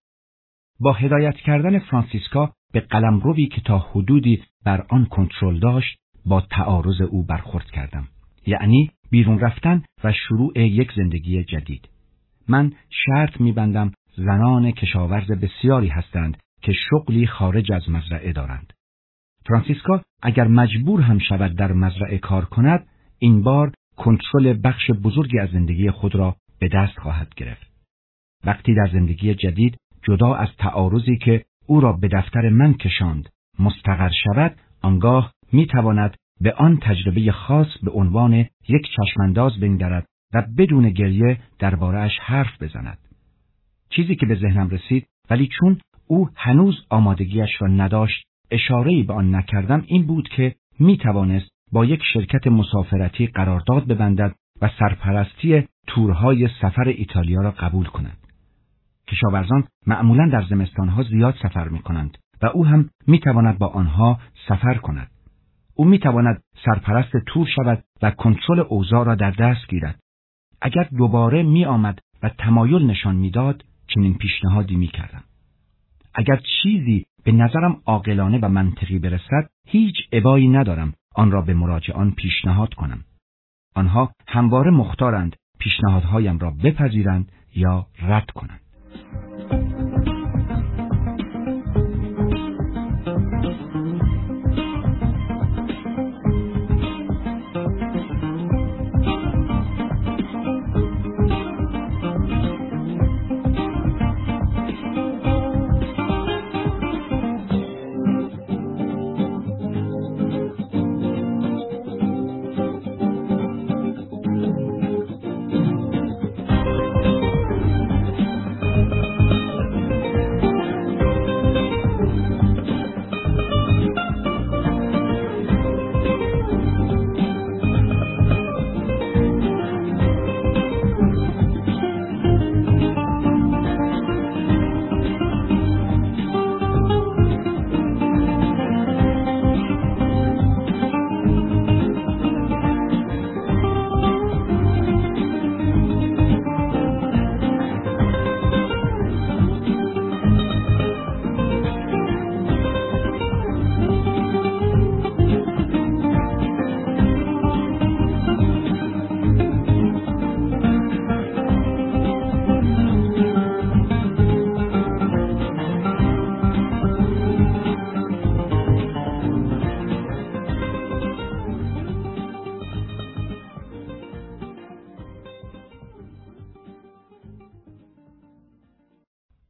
با هدایت کردن فرانسیسکا به قلمروی که تا حدودی بر آن کنترل داشت با تعارض او برخورد کردم. یعنی بیرون رفتن و شروع یک زندگی جدید. من شرط می‌بندم زنان کشاورز بسیاری هستند که شغلی خارج از مزرعه دارند. فرانسیسکا اگر مجبور هم شود در مزرعه کار کند، این بار کنترل بخش بزرگی از زندگی خود را به دست خواهد گرفت. وقتی در زندگی جدید جدا از تعارضی که او را به دفتر من کشاند مستقر شود، آنگاه می‌تواند به آن تجربه خاص به عنوان یک چشمانداز بنگرد و بدون گریه درباره‌اش حرف بزند. چیزی که به ذهنم رسید، ولی چون او هنوز آمادگیش را نداشت اشاره‌ای به آن نکردم، این بود که می توانست با یک شرکت مسافرتی قرارداد ببندد و سرپرستی تورهای سفر ایتالیا را قبول کند. کشاورزان معمولاً در زمستانها زیاد سفر می کنند و او هم می تواند با آنها سفر کند. او می تواند سرپرست تور شود و کنترل اوضاع را در دست گیرد. اگر دوباره می آمد و تمایل نشان می داد، چنین پیشنهادی می کردم. اگر چیزی به نظرم عاقلانه و منطقی برسد، هیچ ابایی ندارم آن را به مراجعان پیشنهاد کنم. آنها همواره مختارند پیشنهادهایم را بپذیرند یا رد کنند.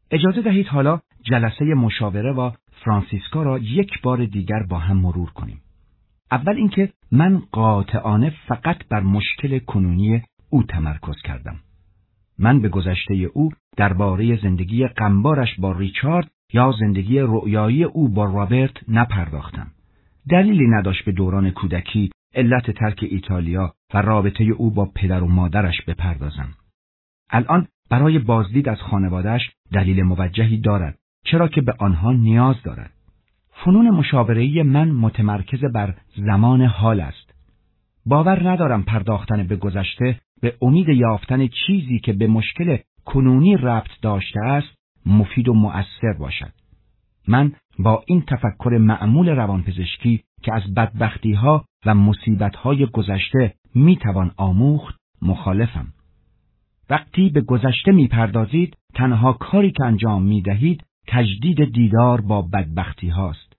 اجازه دهید حالا جلسه مشاوره با فرانسیسکا را یک بار دیگر با هم مرور کنیم. اول اینکه من قاطعانه فقط بر مشکل کنونی او تمرکز کردم. من به گذشته او درباره زندگی غمبارش با ریچارد یا زندگی رؤیایی او با رابرت نپرداختم. دلیلی نداشت به دوران کودکی، علت ترک ایتالیا و رابطه او با پدر و مادرش بپردازم. الان برای بازدید از خانواده‌اش دلیل موجهی دارد، چرا که به آنها نیاز دارد. فنون مشاوره‌ای من متمرکز بر زمان حال است. باور ندارم پرداختن به گذشته به امید یافتن چیزی که به مشکل کنونی ربط داشته است مفید و مؤثر باشد. من با این تفکر معمول روانپزشکی که از بدبختی‌ها و مصیبت‌های گذشته می‌توان آموخت مخالفم. وقتی به گذشته می‌پردازید، تنها کاری که انجام می‌دهید تجدید دیدار با بدبختی هاست.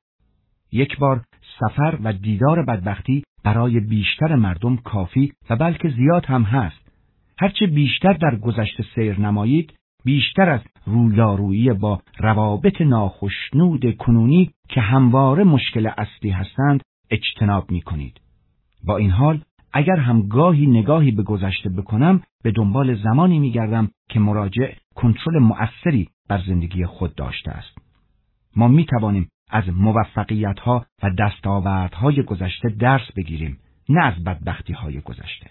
یک بار سفر و دیدار بدبختی برای بیشتر مردم کافی و بلکه زیاد هم هست. هرچه بیشتر در گذشته سیر نمایید، بیشتر از رویارویی با روابط ناخشنود کنونی که همواره مشکل اصلی هستند اجتناب می کنید. با این حال اگر هم گاهی نگاهی به گذشته بکنم، به دنبال زمانی می گردم که مراجع کنترل مؤثری بر زندگی خود داشته است. ما می توانیم از موفقیت‌ها و دستاوردهای گذشته درس بگیریم، نه از بدبختی‌های گذشته.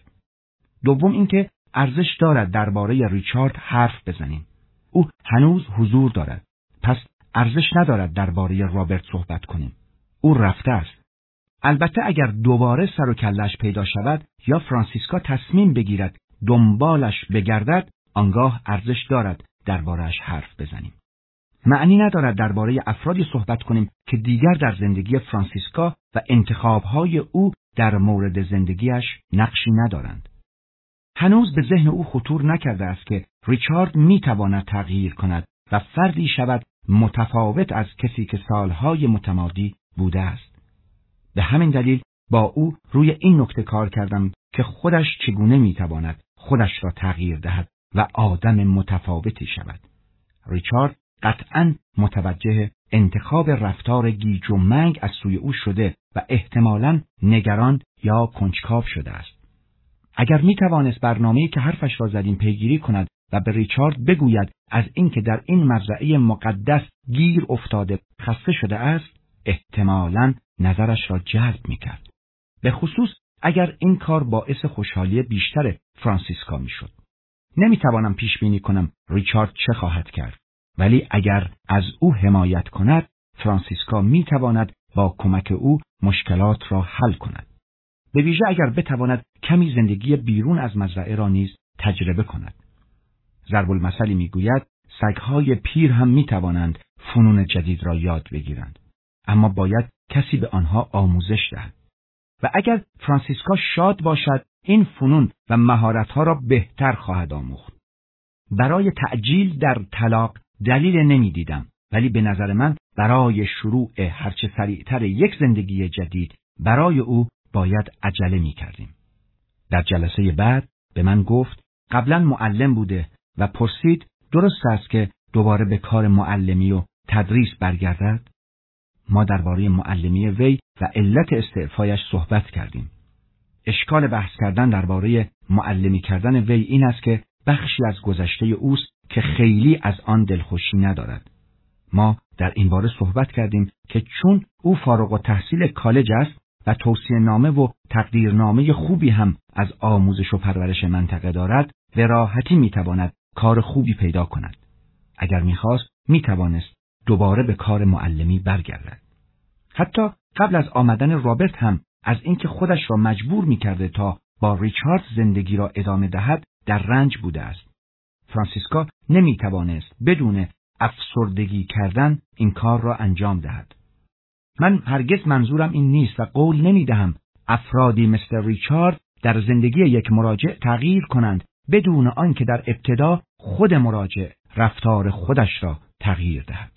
دوم اینکه ارزش دارد درباره ریچارد حرف بزنیم. او هنوز حضور دارد. پس ارزش ندارد درباره رابرت صحبت کنیم. او رفته است. البته اگر دوباره سر و کله‌اش پیدا شود یا فرانسیسکا تصمیم بگیرد دنبالش بگردد، آنگاه ارزش دارد درباره‌اش حرف بزنیم. معنی ندارد درباره افرادی صحبت کنیم که دیگر در زندگی فرانسیسکا و انتخاب‌های او در مورد زندگیش نقشی ندارند. هنوز به ذهن او خطور نکرده است که ریچارد میتواند تغییر کند و فردی شود متفاوت از کسی که سالهای متمادی بوده است. به همین دلیل با او روی این نکته کار کردم که خودش چگونه میتواند خودش را تغییر دهد و آدم متفاوتی شود. ریچارد قطعاً متوجه انتخاب رفتار گیج و منگ از سوی او شده و احتمالاً نگران یا کنجکاو شده است. اگر می توانست برنامه‌ای که حرفش را زدیم پیگیری کند و به ریچارد بگوید از اینکه در این مزرعه مقدس گیر افتاده خسته شده است، احتمالاً نظرش را جلب می کرد. به خصوص اگر این کار باعث خوشحالی بیشتر فرانسیسکا می شد. نمی توانم پیش بینی کنم ریچارد چه خواهد کرد، ولی اگر از او حمایت کند، فرانسیسکا می تواند با کمک او مشکلات را حل کند. به ویژه اگر بتواند کمی زندگی بیرون از مزرعه را نیز تجربه کند. ضرب المثلی میگوید سگهای پیر هم می توانند فنون جدید را یاد بگیرند، اما باید کسی به آنها آموزش دهد. و اگر فرانسیسکا شاد باشد، این فنون و مهارت‌ها را بهتر خواهد آموخت. برای تعجیل در طلاق دلیل نمی دیدم، ولی به نظر من برای شروع هرچه سریعتر یک زندگی جدید برای او باید عجله می کردیم. در جلسه بعد به من گفت قبلا معلم بوده و پرسید درست است که دوباره به کار معلمی و تدریس برگردد؟ ما درباره معلمی وی و علت استعفایش صحبت کردیم. اشکال بحث کردن درباره معلمی کردن وی این است که بخشی از گذشته اوست که خیلی از آن دلخوشی ندارد. ما در این باره صحبت کردیم که چون او فارغ التحصیل کالج است و توصیه نامه و تقدیرنامه خوبی هم از آموزش و پرورش منطقه دارد، به راحتی میتواند کار خوبی پیدا کند. اگر میخواست میتوانست دوباره به کار معلمی برگردد. حتی قبل از آمدن رابرت هم از اینکه خودش را مجبور میکرده تا با ریچارد زندگی را ادامه دهد در رنج بوده است. فرانسیسکا نمیتوانست بدون افسردگی کردن این کار را انجام دهد. من هرگز منظورم این نیست و قول نمیدهم افرادی مثل ریچارد در زندگی یک مراجع تغییر کنند بدون آنکه در ابتدا خود مراجع رفتار خودش را تغییر دهد.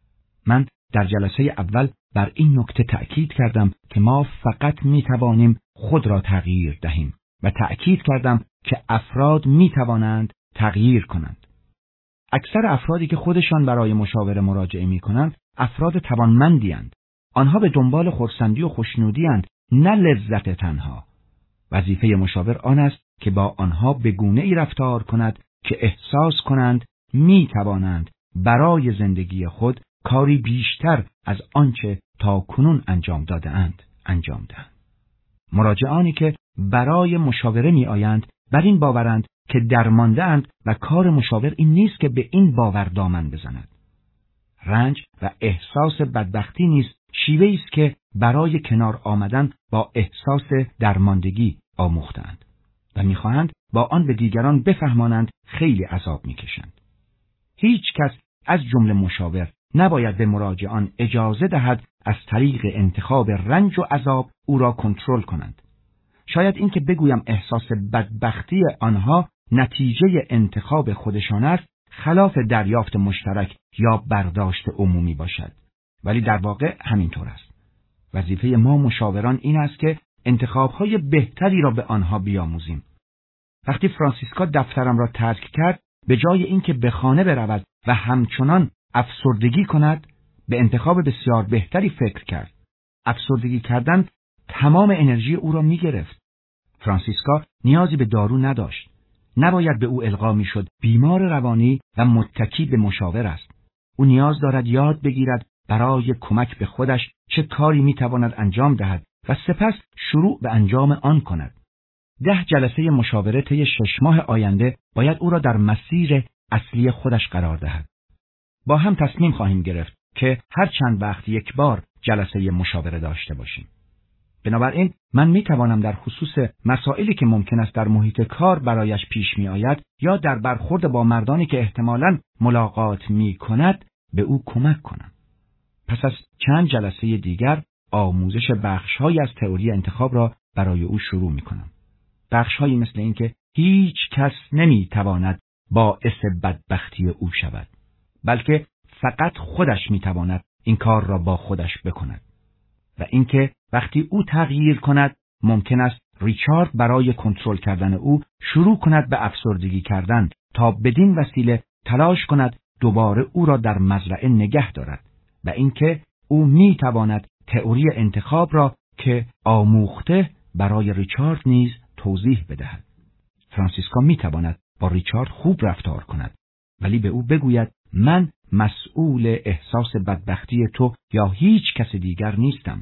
من در جلسه اول بر این نکته تأکید کردم که ما فقط می توانیم خود را تغییر دهیم و تأکید کردم که افراد می توانند تغییر کنند. اکثر افرادی که خودشان برای مشاوره مراجعه می‌کنند افراد توانمندی اند. آنها به دنبال خرسندی و خوشنودی اند، نه لذت تنها. وظیفه مشاور آن است که با آنها به گونه‌ای رفتار کند که احساس کنند می‌توانند برای زندگی خود کاری بیشتر از آنچه تا کنون انجام داده اند انجام دهند. مراجعانی که برای مشاوره می آیند بر این باورند که درمانده اند و کار مشاور این نیست که به این باور دامن بزند. رنج و احساس بدبختی نیز شیوه‌ای است که برای کنار آمدن با احساس درماندگی آموختند و می‌خواهند با آن به دیگران بفهمانند خیلی عذاب می‌کشند. هیچ کس از جمله مشاور نباید به مراجعان اجازه دهد از طریق انتخاب رنج و عذاب او را کنترل کنند. شاید این که بگویم احساس بدبختی آنها نتیجه انتخاب خودشان است خلاف دریافت مشترک یا برداشت عمومی باشد، ولی در واقع همینطور است. وظیفه ما مشاوران این است که انتخاب‌های بهتری را به آنها بیاموزیم. وقتی فرانسیسکا دفترم را ترک کرد، به جای اینکه به خانه برود و همچنان افسردگی کند، به انتخاب بسیار بهتری فکر کرد. افسردگی کردن تمام انرژی او را می گرفت. فرانسیسکا نیازی به دارو نداشت. نباید به او القا می شد بیمار روانی و متکی به مشاور است. او نیاز دارد یاد بگیرد برای کمک به خودش چه کاری می تواند انجام دهد و سپس شروع به انجام آن کند. ده جلسه مشاوره طی شش ماه آینده باید او را در مسیر اصلی خودش قرار دهد. با هم تصمیم خواهیم گرفت که هر چند وقت یک بار جلسه مشاوره داشته باشیم. بنابراین من می توانم در خصوص مسائلی که ممکن است در محیط کار برایش پیش می آید یا در برخورد با مردانی که احتمالاً ملاقات می کند به او کمک کنم. پس از چند جلسه دیگر آموزش بخش‌هایی از تئوری انتخاب را برای او شروع می کنم. بخش‌هایی مثل این که هیچ کس نمی تواند باعث بدبختی او شود، بلکه فقط خودش می تواند این کار را با خودش بکند. و اینکه وقتی او تغییر کند ممکن است ریچارد برای کنترل کردن او شروع کند به افسردگی کردن تا بدین وسیله تلاش کند دوباره او را در مزرعه نگه دارد و اینکه او می تواند تئوری انتخاب را که آموخته برای ریچارد نیز توضیح بدهد. فرانسیسکا می تواند با ریچارد خوب رفتار کند، ولی به او بگوید من مسئول احساس بدبختی تو یا هیچ کس دیگر نیستم.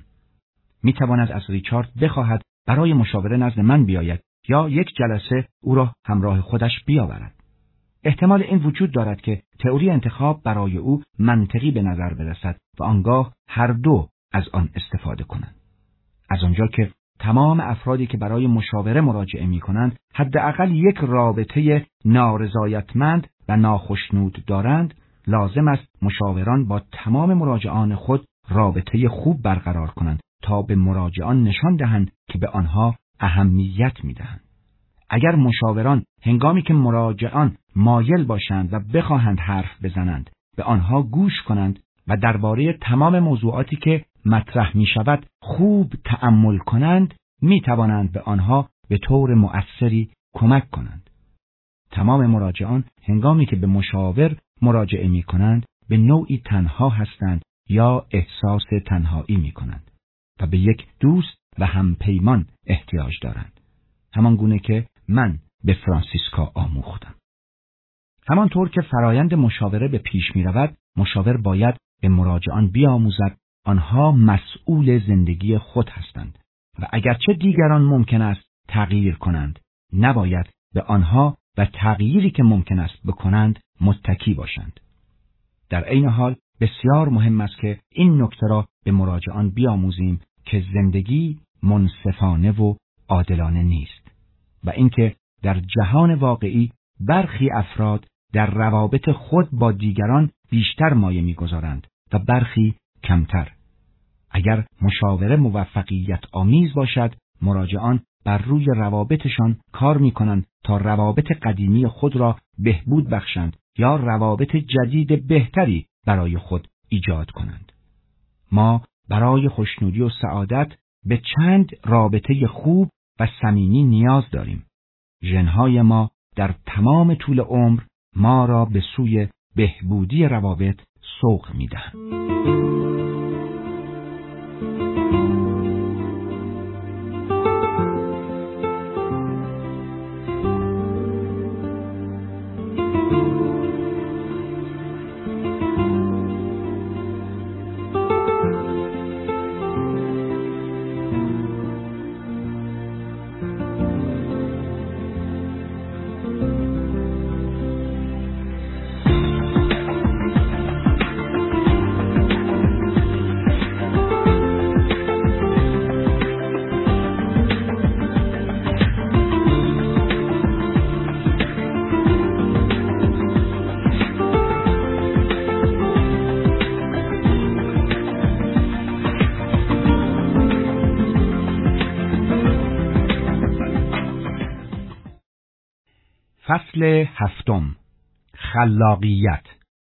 می تواند از ریچارد بخواهد برای مشاوره نزد من بیاید یا یک جلسه او را همراه خودش بیاورد. احتمال این وجود دارد که تئوری انتخاب برای او منطقی به نظر برسد و آنگاه هر دو از آن استفاده کنند. از آنجا که تمام افرادی که برای مشاوره مراجعه می کنند حداقل یک رابطه نارضایتمند و ناخشنود دارند، لازم است مشاوران با تمام مراجعان خود رابطه خوب برقرار کنند تا به مراجعان نشان دهند که به آنها اهمیت می دهند. اگر مشاوران هنگامی که مراجعان مایل باشند و بخواهند حرف بزنند به آنها گوش کنند و درباره تمام موضوعاتی که مطرح می شود خوب تأمل کنند، می توانند به آنها به طور مؤثری کمک کنند. تمام مراجعان هنگامی که به مشاور مراجعه می کنند به نوعی تنها هستند یا احساس تنهایی می کنند و به یک دوست و همپیمان احتیاج دارند، همان گونه که من به فرانسیسکا آموختم. همانطور که فرایند مشاوره به پیش می رود، مشاور باید به مراجعان بیاموزد آنها مسئول زندگی خود هستند و اگرچه دیگران ممکن است تغییر کنند، نباید به آنها و تغییری که ممکن است بکنند متکی باشند. در عین حال بسیار مهم است که این نکته را به مراجعان بیاموزیم که زندگی منصفانه و عادلانه نیست و اینکه در جهان واقعی برخی افراد در روابط خود با دیگران بیشتر مایه می‌گذارند و برخی کمتر. اگر مشاوره موفقیت آمیز باشد، مراجعان بر روی روابطشان کار می‌کنند تا روابط قدیمی خود را بهبود بخشند یا روابط جدید بهتری برای خود ایجاد کنند. ما برای خوشنودی و سعادت به چند رابطه خوب و صمیمی نیاز داریم. ژن‌های ما در تمام طول عمر ما را به سوی بهبودی روابط سوق می‌دهند. فصل هفتم، خلاقیت.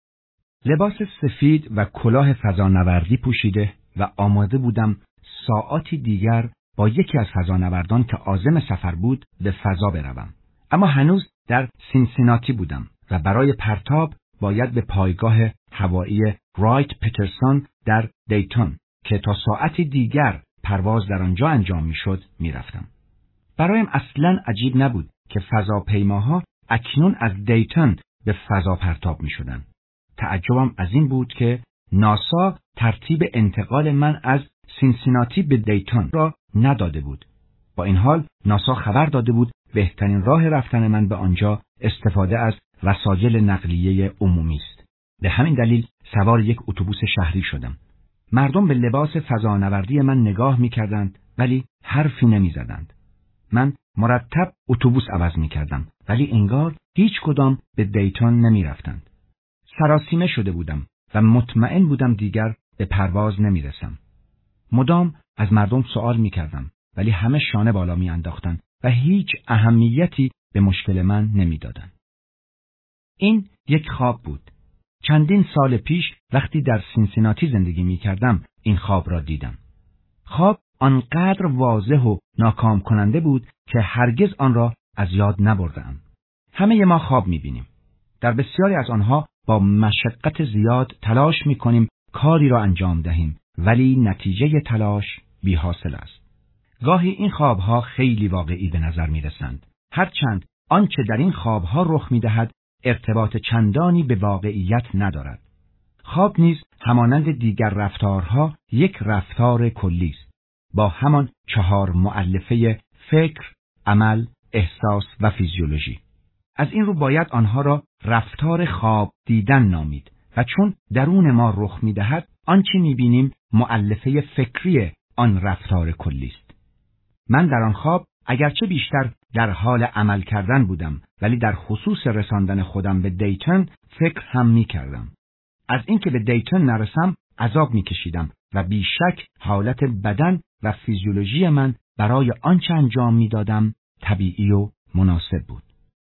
لباس سفید و کلاه فضانوردی پوشیده و آماده بودم ساعاتی دیگر با یکی از فضانوردان که عازم سفر بود به فضا بروم. اما هنوز در سینسیناتی بودم و برای پرتاب باید به پایگاه هوایی رایت پترسون در دیتون که تا ساعتی دیگر پرواز در آنجا انجام میشد میرفتم. برایم اصلاً عجیب نبود که فضاپیماها اکنون از دیتون به فضا پرتاب می شدن. تعجبم از این بود که ناسا ترتیب انتقال من از سینسیناتی به دیتون را نداده بود. با این حال ناسا خبر داده بود بهترین راه رفتن من به آنجا استفاده از وسایل نقلیه عمومی است. به همین دلیل سوار یک اتوبوس شهری شدم. مردم به لباس فضانوردی من نگاه می کردند ولی حرفی نمی زدند. من مرتب اتوبوس عوض می کردم ولی انگار هیچ کدام به دیتون نمی رفتند. سراسیمه شده بودم و مطمئن بودم دیگر به پرواز نمی رسم. مدام از مردم سوال می کردم ولی همه شانه بالا می انداختند و هیچ اهمیتی به مشکل من نمی دادند. این یک خواب بود. چندین سال پیش وقتی در سینسیناتی زندگی می کردم این خواب را دیدم. خواب آنقدر واضح و ناکام کننده بود که هرگز آن را از یاد نبردم. همه ما خواب می‌بینیم. در بسیاری از آنها با مشقت زیاد تلاش می‌کنیم کاری را انجام دهیم ولی نتیجه تلاش بی‌حاصل است. گاهی این خواب‌ها خیلی واقعی به نظر می‌رسند. هرچند آنچه در این خواب‌ها رخ می‌دهد ارتباط چندانی به واقعیت ندارد. خواب نیز همانند دیگر رفتارها یک رفتار کلی است. با همان چهار مؤلفه فکر، عمل، احساس و فیزیولوژی. از این رو باید آنها را رفتار خواب دیدن نامید و چون درون ما رخ می‌دهد آنچه می‌بینیم مؤلفه فکری آن رفتار کلی است. من در آن خواب اگرچه بیشتر در حال عمل کردن بودم ولی در خصوص رساندن خودم به دیتون فکر هم می‌کردم. از اینکه به دیتون نرسم عذاب می‌کشیدم و بیشک حالت بدن و فیزیولوژی من برای آنچه انجام می‌دادم طبیعی و مناسب بود.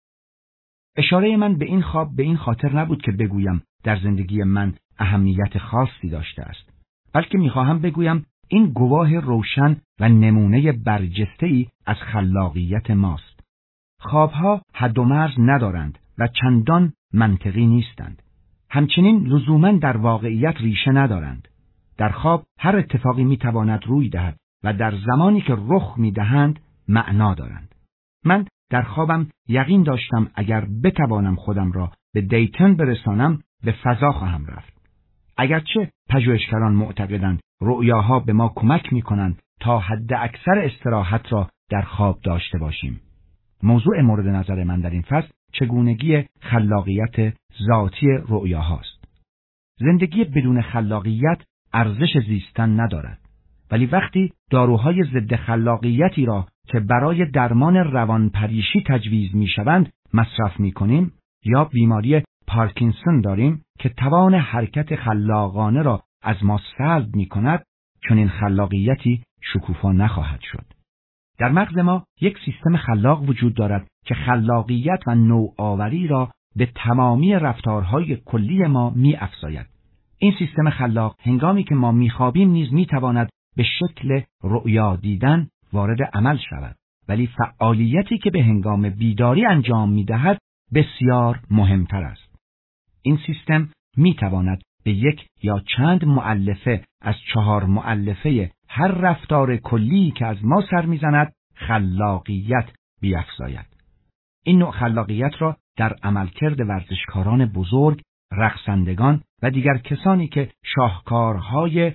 اشاره من به این خواب به این خاطر نبود که بگویم در زندگی من اهمیت خاصی داشته است، بلکه می‌خواهم بگویم این گواه روشن و نمونه برجسته‌ای از خلاقیت ماست. خوابها حد و مرز ندارند و چندان منطقی نیستند. همچنین لزوماً در واقعیت ریشه ندارند. در خواب هر اتفاقی می‌تواند روی دهد و در زمانی که رخ می‌دهند معنا دارند. من در خوابم یقین داشتم اگر بتوانم خودم را به دیتون برسانم به فضا خواهم رفت. اگرچه پژوهشگران معتقدند رؤیاها به ما کمک می‌کنند تا حد اکثر استراحت را در خواب داشته باشیم. موضوع مورد نظر من در این فصل چگونگی خلاقیت ذاتی رؤیاهاست. زندگی بدون خلاقیت ارزش زیستن ندارد. ولی وقتی داروهای ضد خلاقیتی را که برای درمان روانپریشی تجویز می‌شوند مصرف می‌کنیم یا بیماری پارکینسون داریم که توان حرکت خلاقانه را از ما سلب می‌کند، چون این خلاقیتی شکوفا نخواهد شد. در مغز ما یک سیستم خلاق وجود دارد که خلاقیت و نوآوری را به تمامی رفتارهای کلی ما می‌افزاید. این سیستم خلاق هنگامی که ما می‌خوابیم نیز می‌تواند به شکل رؤیا دیدن وارد عمل شود، ولی فعالیتی که به هنگام بیداری انجام می‌دهد بسیار مهمتر است. این سیستم می تواند به یک یا چند مؤلفه از چهار مؤلفه هر رفتار کلی که از ما سر می‌زند خلاقیت بیفزاید. این نوع خلاقیت را در عملکرد ورزشکاران بزرگ، رقصندگان و دیگر کسانی که شاهکارهای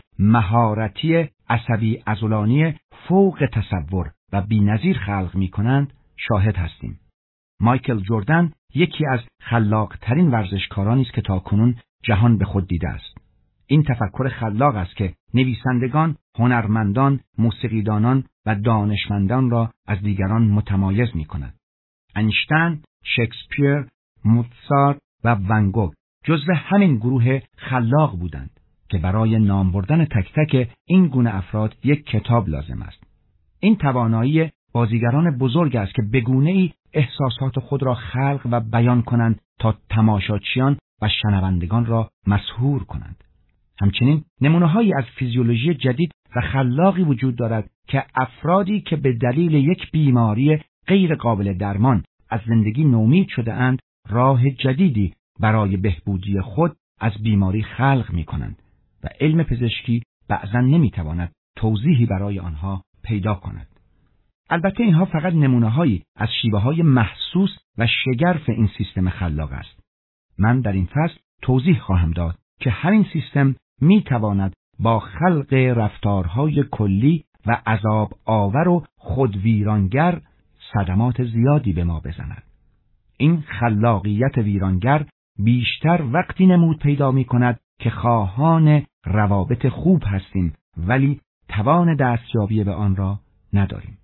مهارتی عصبی عضلانی فوق تصور و بی‌نظیر خلق می‌کنند شاهد هستیم. مایکل جردن یکی از خلاق‌ترین ورزشکارانی است که تاکنون جهان به خود دیده است. این تفکر خلاق است که نویسندگان، هنرمندان، موسیقیدانان و دانشمندان را از دیگران متمایز می‌کند. اینشتین، شکسپیر، موزارت و ون گوگ جزو همین گروه خلاق بودند که برای نام بردن تک تک این گونه افراد یک کتاب لازم است. این توانایی بازیگران بزرگ است که به گونه‌ای احساسات خود را خلق و بیان کنند تا تماشاچیان و شنوندگان را مسحور کنند. همچنین نمونه‌هایی از فیزیولوژی جدید و خلاقی وجود دارد که افرادی که به دلیل یک بیماری غیر قابل درمان از زندگی نومید شده اند، راه جدیدی برای بهبودی خود از بیماری خلق می‌کنند و علم پزشکی بعضاً نمی‌تواند توضیحی برای آنها پیدا کند. البته اینها فقط نمونه‌هایی از شیوه‌های محسوس و شگرف این سیستم خلاق است. من در این فصل توضیح خواهم داد که همین سیستم می‌تواند با خلق رفتارهای کلی و عذاب آور و خودویرانگر صدمات زیادی به ما بزند. این خلاقیت ویرانگر بیشتر وقتی نمود پیدا می‌کند که خواهان روابط خوب هستیم ولی توان دستیابی به آن را نداریم.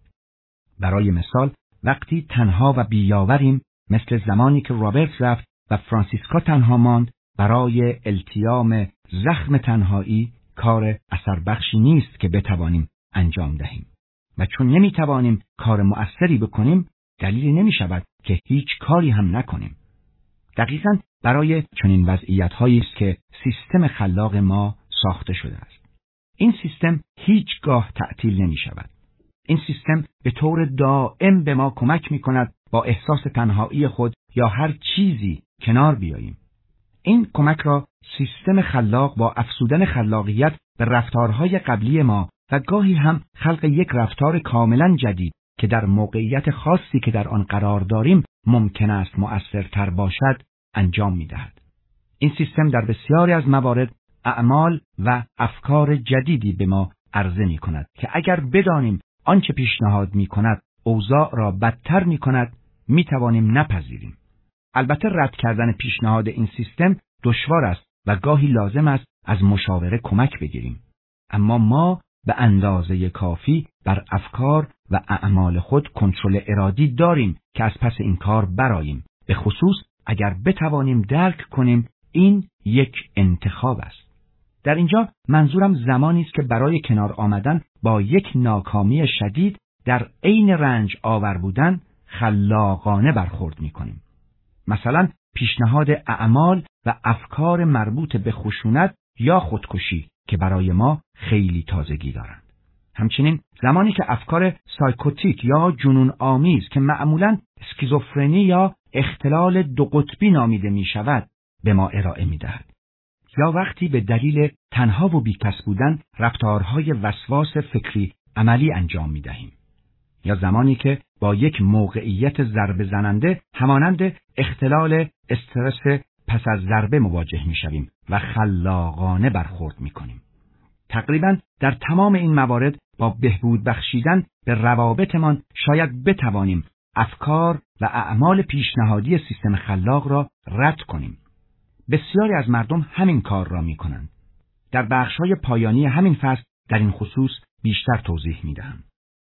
برای مثال وقتی تنها و بیاوریم، مثل زمانی که رابرت رفت و فرانسیسکا تنها ماند، برای التیام زخم تنهایی کار اثر بخشی نیست که بتوانیم انجام دهیم و چون نمیتوانیم کار مؤثری بکنیم دلیلی نمی شود که هیچ کاری هم نکنیم. دقیقاً برای چنین وضعیت‌هایی است که سیستم خلاق ما ساخته شده است. این سیستم هیچگاه تعطیل نمی شود. این سیستم به طور دائم به ما کمک می کند با احساس تنهایی خود یا هر چیزی کنار بیاییم. این کمک را سیستم خلاق با افزودن خلاقیت به رفتارهای قبلی ما و گاهی هم خلق یک رفتار کاملا جدید که در موقعیت خاصی که در آن قرار داریم ممکن است مؤثرتر باشد انجام می دهد. این سیستم در بسیاری از موارد اعمال و افکار جدیدی به ما عرضه می کند که اگر بدانیم آنچه پیشنهاد می کند اوضاع را بدتر می کند می توانیم نپذیریم. البته رد کردن پیشنهاد این سیستم دشوار است و گاهی لازم است از مشاوره کمک بگیریم. اما ما به اندازه کافی بر افکار و اعمال خود کنترل ارادی داریم که از پس این کار برآییم، به خصوص اگر بتوانیم درک کنیم این یک انتخاب است. در اینجا منظورم زمانی است که برای کنار آمدن با یک ناکامی شدید در عین رنج آور بودن خلاقانه برخورد می‌کنیم. مثلا پیشنهاد اعمال و افکار مربوط به خشونت یا خودکشی که برای ما خیلی تازگی دارند. همچنین زمانی که افکار سایکوتیک یا جنون آمیز که معمولاً اسکیزوفرنی یا اختلال دو قطبی نامیده می شود به ما ارائه می دهد. یا وقتی به دلیل تنها و بیکس بودن رفتارهای وسواس فکری عملی انجام می دهیم. یا زمانی که با یک موقعیت ضربه زننده همانند اختلال استرس پس از ضربه مواجه می شویم و خلاقانه برخورد می کنیم. تقریباً در تمام این موارد با بهبود بخشیدن به روابطمان شاید بتوانیم افکار و اعمال پیشنهادی سیستم خلاق را رد کنیم. بسیاری از مردم همین کار را می کنند. در بخش‌های پایانی همین فصل در این خصوص بیشتر توضیح می دهم.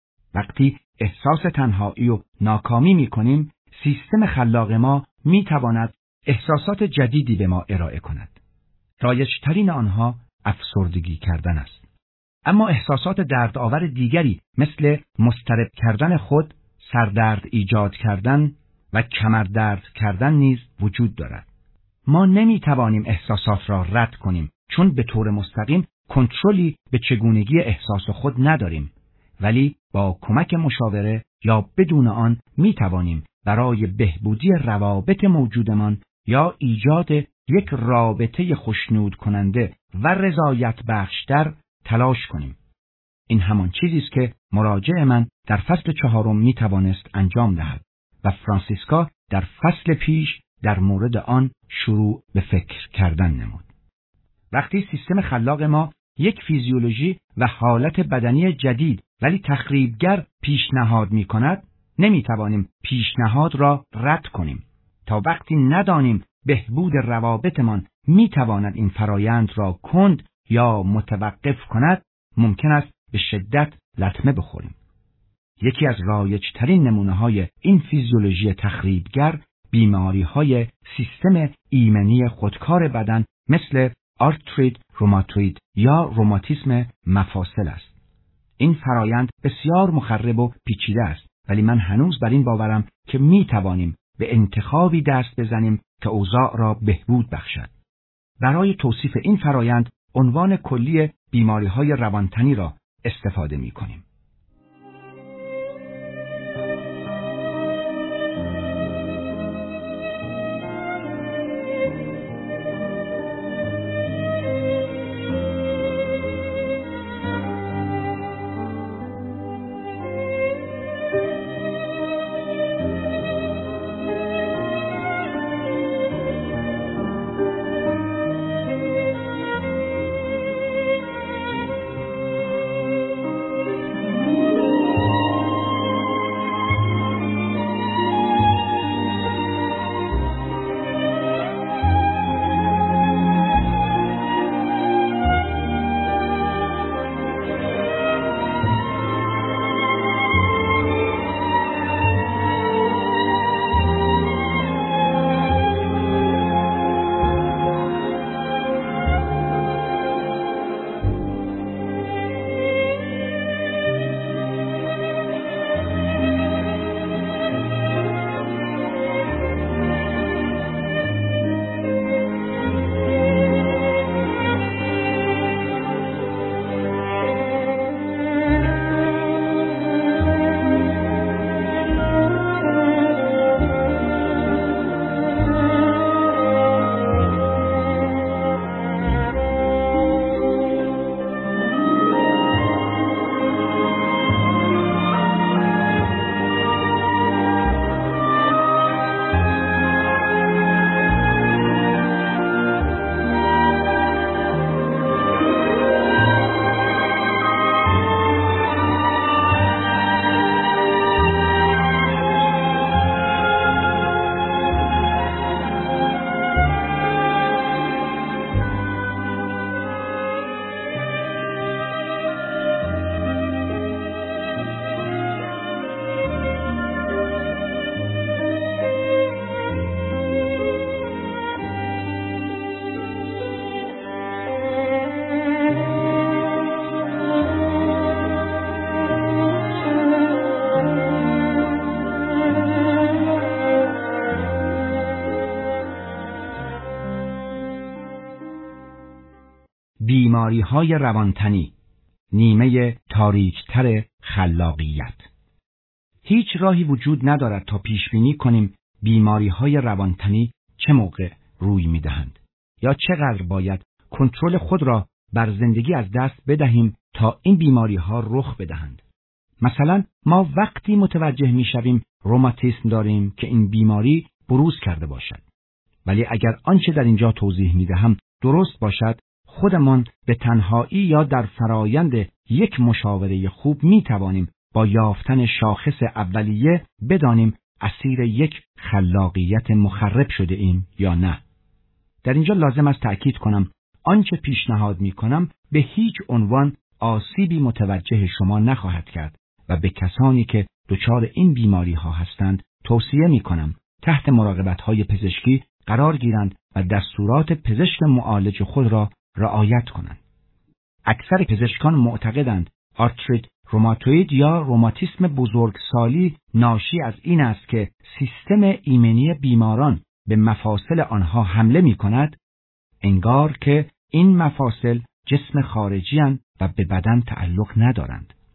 وقتی احساس تنهایی و ناکامی می کنیم، سیستم خلاق ما می تواند احساسات جدیدی به ما ارائه کند. رایج‌ترین آنها افسردگی کردن است. اما احساسات دردآور دیگری مثل مضطرب کردن خود، سردرد ایجاد کردن و کمردرد کردن نیز وجود دارد. ما نمی توانیم احساسات را رد کنیم چون به طور مستقیم کنترلی به چگونگی احساس خود نداریم، ولی با کمک مشاوره یا بدون آن می توانیم برای بهبودی روابط موجودمان یا ایجاد یک رابطه خوشنود کننده و رضایت بخشتر تلاش کنیم. این همان چیزی است که مراجع من در فصل چهارم می توانست انجام دهد و فرانسیسکا در فصل پیش در مورد آن شروع به فکر کردن نمود. وقتی سیستم خلاق ما یک فیزیولوژی و حالت بدنی جدید ولی تخریبگر پیشنهاد می کند، نمی توانیم پیشنهاد را رد کنیم. تا وقتی ندانیم بهبود روابطمان می تواند این فرایند را کند یا متوقف کند، ممکن است به شدت لطمه بخوریم. یکی از رایج‌ترین نمونه‌های این فیزیولوژی تخریبگر بیماری‌های سیستم ایمنی خودکار بدن مثل آرتریت روماتوید یا روماتیسم مفاصل است. این فرایند بسیار مخرب و پیچیده است، ولی من هنوز بر این باورم که می توانیم به انتخابی دست بزنیم که اوضاع را بهبود بخشد. برای توصیف این فرایند عنوان کلی بیماری‌های روانتنی را استفاده می کنیم. بیماری‌های روانتنی، نیمه تاریک‌تر خلاقیت. هیچ راهی وجود ندارد تا پیش‌بینی کنیم بیماری‌های روانتنی چه موقع روی می‌دهند یا چقدر باید کنترل خود را بر زندگی از دست بدهیم تا این بیماری‌ها رخ بدهند. مثلا ما وقتی متوجه می‌شویم روماتیسم داریم که این بیماری بروز کرده باشد. ولی اگر آنچه در اینجا توضیح می‌دهم درست باشد، خودمان به تنهایی یا در فرایند یک مشاوره خوب می توانیم با یافتن شاخص اولیه بدانیم اسیر یک خلاقیت مخرب شده ایم یا نه. در اینجا لازم است تأکید کنم آنچه پیشنهاد می کنم به هیچ عنوان آسیبی متوجه شما نخواهد کرد و به کسانی که دچار این بیماری ها هستند توصیه می کنم تحت مراقبت های پزشکی قرار گیرند و دستورات پزشک معالج خود را رعایت کنند. اکثر پزشکان معتقدند آرتریت روماتوید یا روماتیسم بزرگسالی ناشی از این است که سیستم ایمنی بیماران به مفاصل آنها حمله می کند، انگار که این مفاصل جسم خارجی اند و به بدن تعلق ندارند.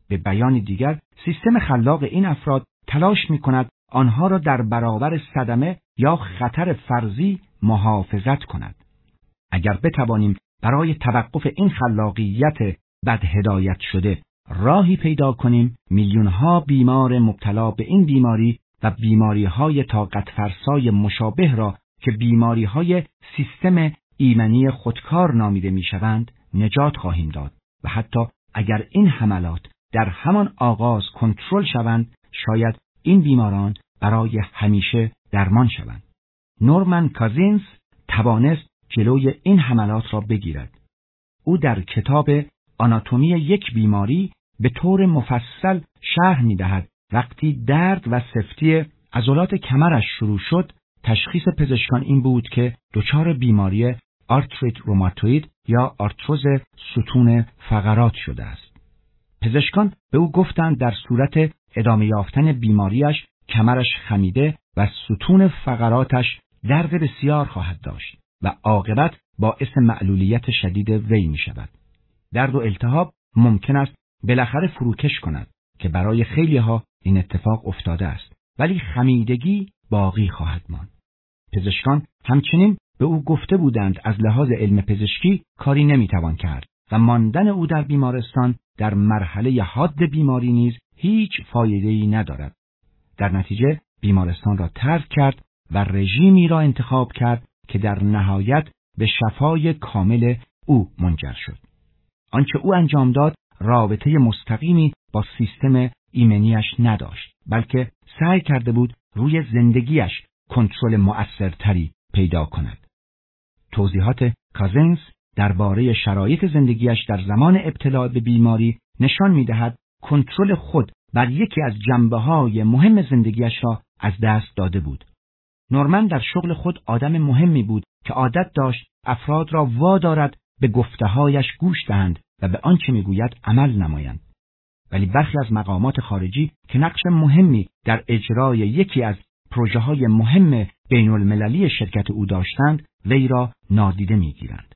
به بیان دیگر، سیستم خلاق این افراد تلاش می‌کند آنها را در برابر صدمه یا خطر فرضی محافظت کند. اگر بتوانیم برای توقف این خلاقیت بد هدایت شده راهی پیدا کنیم، میلیون‌ها بیمار مبتلا به این بیماری و بیماری‌های طاقت فرسای مشابه را که بیماری‌های سیستم ایمنی خودکار نامیده می‌شوند نجات خواهیم داد و حتی اگر این حملات در همان آغاز کنترل شوند، شاید این بیماران برای همیشه درمان شوند. نورمن کازینز توانست جلوی این حملات را بگیرد. او در کتاب آناتومی یک بیماری به طور مفصل شرح می‌دهد وقتی درد و سفتی عضلات کمرش شروع شد، تشخیص پزشکان این بود که دچار بیماری آرتریت روماتوید یا آرتروز ستون فقرات شده است. پزشکان به او گفتند در صورت ادامه یافتن بیماریش کمرش خمیده و ستون فقراتش درد بسیار خواهد داشت و عاقبت باعث معلولیت شدید وی می شود. درد و التهاب ممکن است بالاخره فروکش کند که برای خیلی ها این اتفاق افتاده است، ولی خمیدگی باقی خواهد ماند. پزشکان همچنین به او گفته بودند از لحاظ علم پزشکی کاری نمیتوان کرد و ماندن او در بیمارستان در مرحله حاد بیماری نیز هیچ فایده‌ای ندارد. در نتیجه بیمارستان را ترک کرد و رژیمی را انتخاب کرد که در نهایت به شفای کامل او منجر شد. آنچه او انجام داد رابطه مستقیمی با سیستم ایمنیش نداشت، بلکه سعی کرده بود روی زندگیش کنترل مؤثرتری پیدا کند. توضیحات کازینز درباره شرایط زندگیش در زمان ابتلا به بیماری نشان می‌دهد کنترل خود بر یکی از جنبه‌های مهم زندگیش را از دست داده بود. نورمن در شغل خود آدم مهمی بود که عادت داشت افراد را وادارد به گفته‌هایش گوش دهند و به آنچه می‌گوید عمل نمایند. ولی برخی از مقامات خارجی که نقش مهمی در اجرای یکی از پروژه‌های مهم بین‌المللی شرکت او داشتند، وی را نادیده می‌گیرند.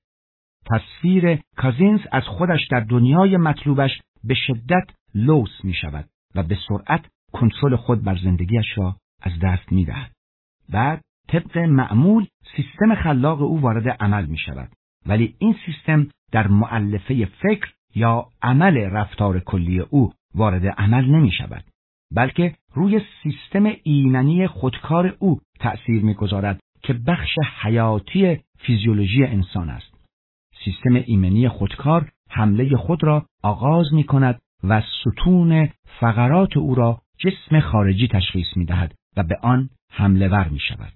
تصویر کازینز از خودش در دنیای مطلوبش به شدت لوث می‌شود و به سرعت کنترل خود بر زندگیش را از دست می‌دهد. بعد طبق معمول سیستم خلاق او وارد عمل می‌شود، ولی این سیستم در مؤلفه فکر یا عمل رفتار کلی او وارد عمل نمی‌شود، بلکه روی سیستم ایمنی خودکار او تأثیر می‌گذارد که بخش حیاتی فیزیولوژی انسان است. سیستم ایمنی خودکار حمله خود را آغاز می‌کند و ستون فقرات او را جسم خارجی تشخیص می‌دهد و به آن حمله ور می‌شود.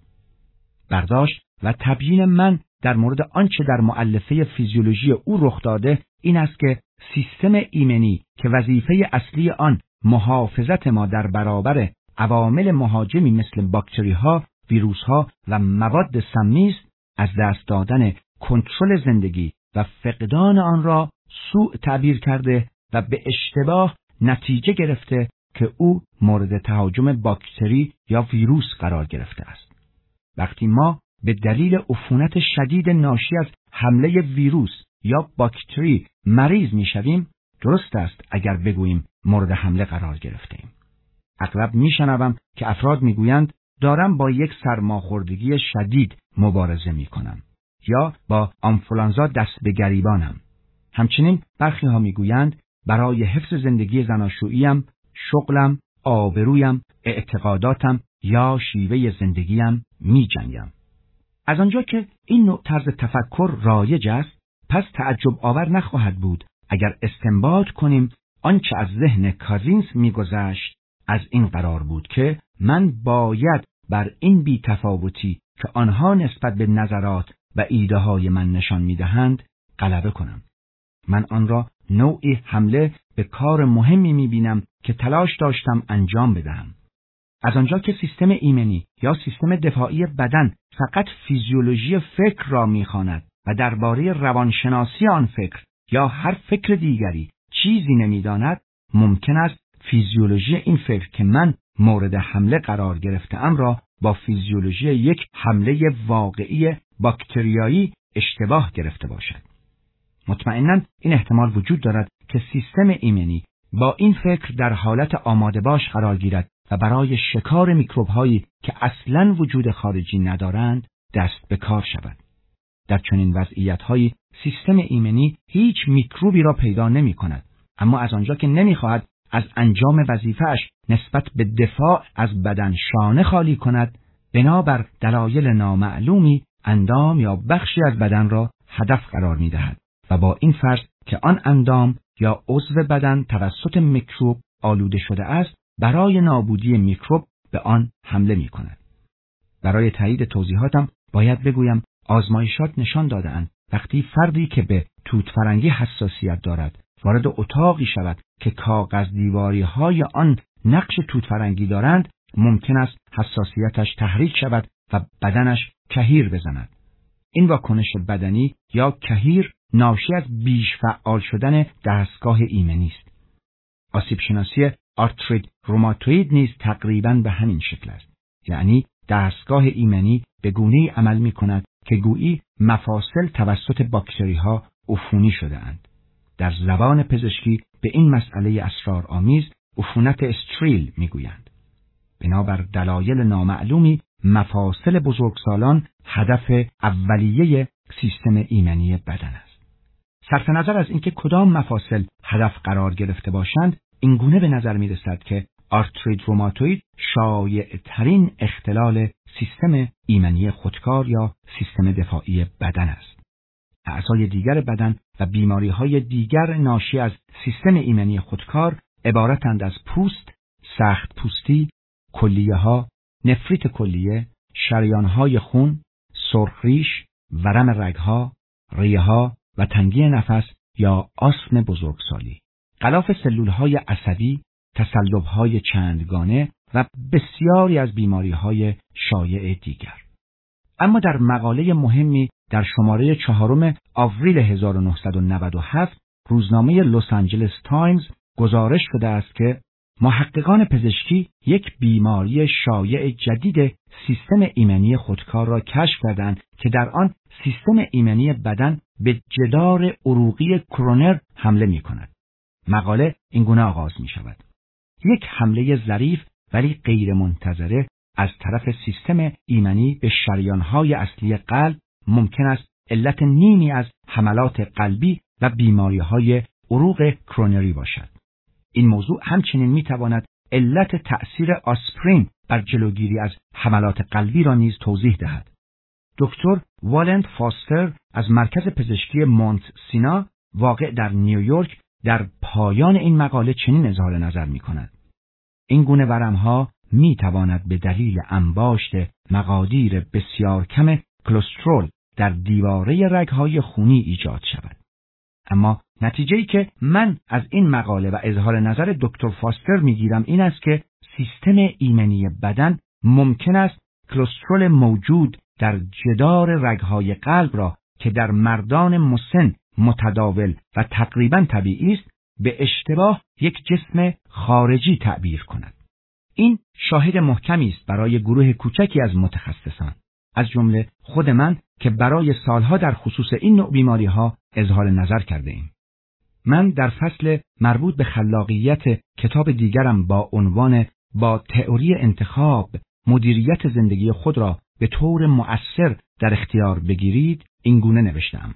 برداشت و تبیین من در مورد آنچه در مؤلفه فیزیولوژی او رخ داده این است که سیستم ایمنی که وظیفه اصلی آن محافظت ما در برابر عوامل مهاجمی مثل باکتری‌ها، ویروس‌ها و مواد سمی است، از دست دادن کنترل زندگی و فقدان آن را سوء تعبیر کرده و به اشتباه نتیجه گرفته که او مورد تهاجم باکتری یا ویروس قرار گرفته است. وقتی ما به دلیل عفونت شدید ناشی از حمله ویروس یا باکتری مریض می‌شویم، درست است اگر بگوییم مورد حمله قرار گرفته‌ایم. اغلب می‌شنوم که افراد می‌گویند دارم با یک سرماخوردگی شدید مبارزه می‌کنم یا با آنفولانزا دست به گریبانم. همچنین برخی ها می‌گویند برای حفظ زندگی زناشوییم، شغلم، آبرویم، اعتقاداتم یا شیوه زندگیم می‌جنگم. از آنجا که این نوع طرز تفکر رایج است، پس تعجب آور نخواهد بود اگر استنباط کنیم آنچه از ذهن کازینز می‌گذشت از این قرار بود که من باید بر این بی‌تفاوتی که آنها نسبت به نظرات و ایده های من نشان می‌دهند غلبه کنم. من آن را نوعی حمله به کار مهمی می‌بینم که تلاش داشتم انجام بدهم. از آنجا که سیستم ایمنی یا سیستم دفاعی بدن فقط فیزیولوژی فکر را می‌خواند و درباره روانشناسی آن فکر یا هر فکر دیگری چیزی نمی‌داند، ممکن است فیزیولوژی این فکر که من مورد حمله قرار گرفته‌ام را با فیزیولوژی یک حمله واقعی باکتریایی اشتباه گرفته باشد. مطمئناً این احتمال وجود دارد که سیستم ایمنی با این فکر در حالت آماده باش قرار گیرد و برای شکار میکروب هایی که اصلاً وجود خارجی ندارند دست به کار شود. در چنین وضعیت هایی سیستم ایمنی هیچ میکروبی را پیدا نمی کند، اما از آنجا که نمی خواهد از انجام وظیفه‌اش نسبت به دفاع از بدن شانه خالی کند، بنابر دلایل نامعلومی اندام یا بخشی از بدن را هدف قرار می دهد و با این فرض که آن اندام یا عضو بدن توسط میکروب آلوده شده است، برای نابودی میکروب به آن حمله می کند. برای تایید توضیحاتم باید بگویم آزمایشات نشان داده‌اند وقتی فردی که به توت فرنگی حساسیت دارد وارد اتاقی شود که کاغذ دیواری های آن نقش توت فرنگی دارند، ممکن است حساسیتش تحریک شود و بدنش کهیر بزند. این واکنش بدنی یا کهیر ناشی از بیش فعال شدن دستگاه ایمنی است. آسیب شناسی آرتریت روماتوئید نیز تقریباً به همین شکل است. یعنی دستگاه ایمنی به گونه‌ای عمل می‌کند که گویی مفاصل توسط باکتری‌ها عفونی شده‌اند. در زبان پزشکی به این مسئله اسرارآمیز عفونت استریل می‌گویند. بنابر دلایل نامعلومی مفاصل بزرگسالان هدف اولیه سیستم ایمنی بدن است. صرف نظر از اینکه کدام مفاصل هدف قرار گرفته باشند، این گونه به نظر می‌رسد که آرتریت روماتوئید شایع‌ترین اختلال سیستم ایمنی خودکار یا سیستم دفاعی بدن است. اعضای دیگر بدن و بیماری‌های دیگر ناشی از سیستم ایمنی خودکار عبارتند از پوست، سخت پوستی، کلیه‌ها، نفریت کلیه، شریان‌های خون، سرخریش، ورم رگ‌ها، ریه‌ها و تنگی نفس یا آسم بزرگسالی. غلاف سلول‌های عصبی، تصلب‌های چندگانه و بسیاری از بیماری‌های شایع دیگر. اما در مقاله مهمی در شماره چهارم آوریل هزار و نهصد و نود و هفت روزنامه لس آنجلس تایمز گزارش شده است که محققان پزشکی یک بیماری شایع جدید سیستم ایمنی خودکار را کشف کردند که در آن سیستم ایمنی بدن به جدار عروقی کرونر حمله می‌کند. مقاله اینگونه آغاز می‌شود: یک حمله ظریف ولی غیر منتظره از طرف سیستم ایمنی به شریان‌های اصلی قلب ممکن است علت نیمی از حملات قلبی و بیماری‌های عروق کرونری باشد. این موضوع همچنین می‌تواند علت تأثیر آسپرین بر جلوگیری از حملات قلبی را نیز توضیح دهد. دکتر والنت فاستر از مرکز پزشکی مونت سینا واقع در نیویورک در پایان این مقاله چنین اظهار نظر می‌کند: این گونه ورم‌ها می‌تواند به دلیل انباشت مقادیر بسیار کم کلسترول در دیواره رگ‌های خونی ایجاد شود. اما نتیجه‌ای که من از این مقاله و اظهار نظر دکتر فاستر می‌گیرم این است که سیستم ایمنی بدن ممکن است کلسترول موجود در جدار رگ‌های قلب را که در مردان مسن متداول و تقریباً طبیعی است به اشتباه یک جسم خارجی تعبیر کند. این شاهد محکمی است برای گروه کوچکی از متخصصان، از جمله خود من که برای سالها در خصوص این نوع بیماری‌ها اظهار نظر کرده ایم. من در فصل مربوط به خلاقیت کتاب دیگرم با عنوان با تئوری انتخاب مدیریت زندگی خود را به طور مؤثر در اختیار بگیرید این گونه نوشتم: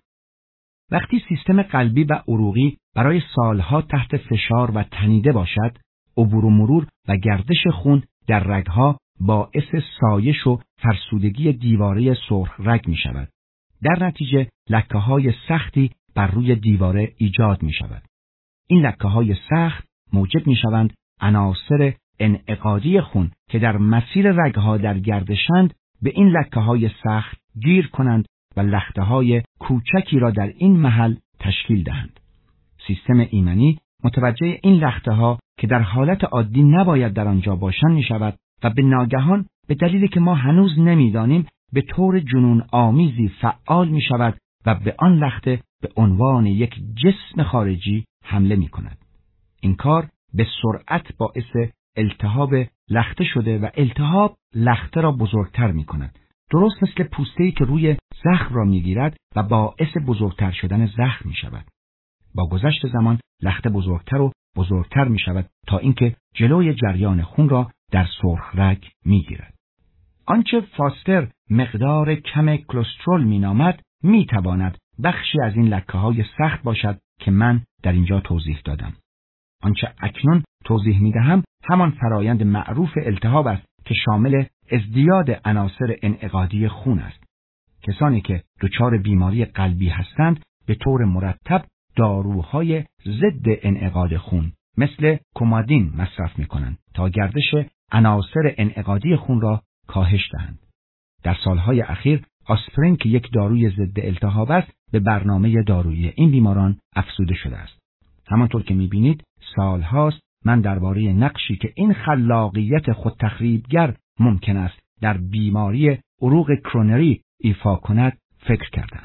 وقتی سیستم قلبی و عروقی برای سالها تحت فشار و تنیده باشد، عبور و مرور و گردش خون در رگها باعث سایش و فرسودگی دیواره سرخ رگ می شود. در نتیجه لکه های سختی بر روی دیواره ایجاد می شود. این لکه های سخت موجب می شوند عناصر انعقادی خون که در مسیر رگها در گردشند به این لکه های سخت گیر کنند و لخته های کوچکی را در این محل تشکیل دهند. سیستم ایمنی متوجه این لخته ها که در حالت عادی نباید در آنجا باشند می شود و به ناگهان به دلیلی که ما هنوز نمیدانیم به طور جنون آمیزی فعال می شود و به آن لخته به عنوان یک جسم خارجی حمله می کند. این کار به سرعت باعث التهاب لخته شده و التهاب لخته را بزرگتر می کند. درست مثل پوسته‌ای که روی زخم را می گیرد و باعث بزرگتر شدن زخم می شود. با گذشت زمان لخته بزرگتر و بزرگتر می شود تا اینکه جلوی جریان خون را در سرخ رگ می گیرد. آنچه فاستر مقدار کم کلسترول می نامد می تواند بخشی از این لکه های سخت باشد که من در اینجا توضیح دادم. آنچه اکنون توضیح می دهم همان فرایند معروف التهاب است که شامل ازدیاد عناصر انعقادی خون است. کسانی که دچار بیماری قلبی هستند به طور مرتب داروهای ضد انعقاد خون مثل کومادین مصرف می کنند تا گردش عناصر انعقادی خون را کاهش دهند. در سالهای اخیر آسپرین که یک داروی ضد التهاب است به برنامه دارویی این بیماران افزوده شده است. همانطور که می بینید سالهاست من درباره نقشی که این خلاقیت خودتخریبگر ممکن است در بیماری عروق کرونری ایفا کند فکر کردم.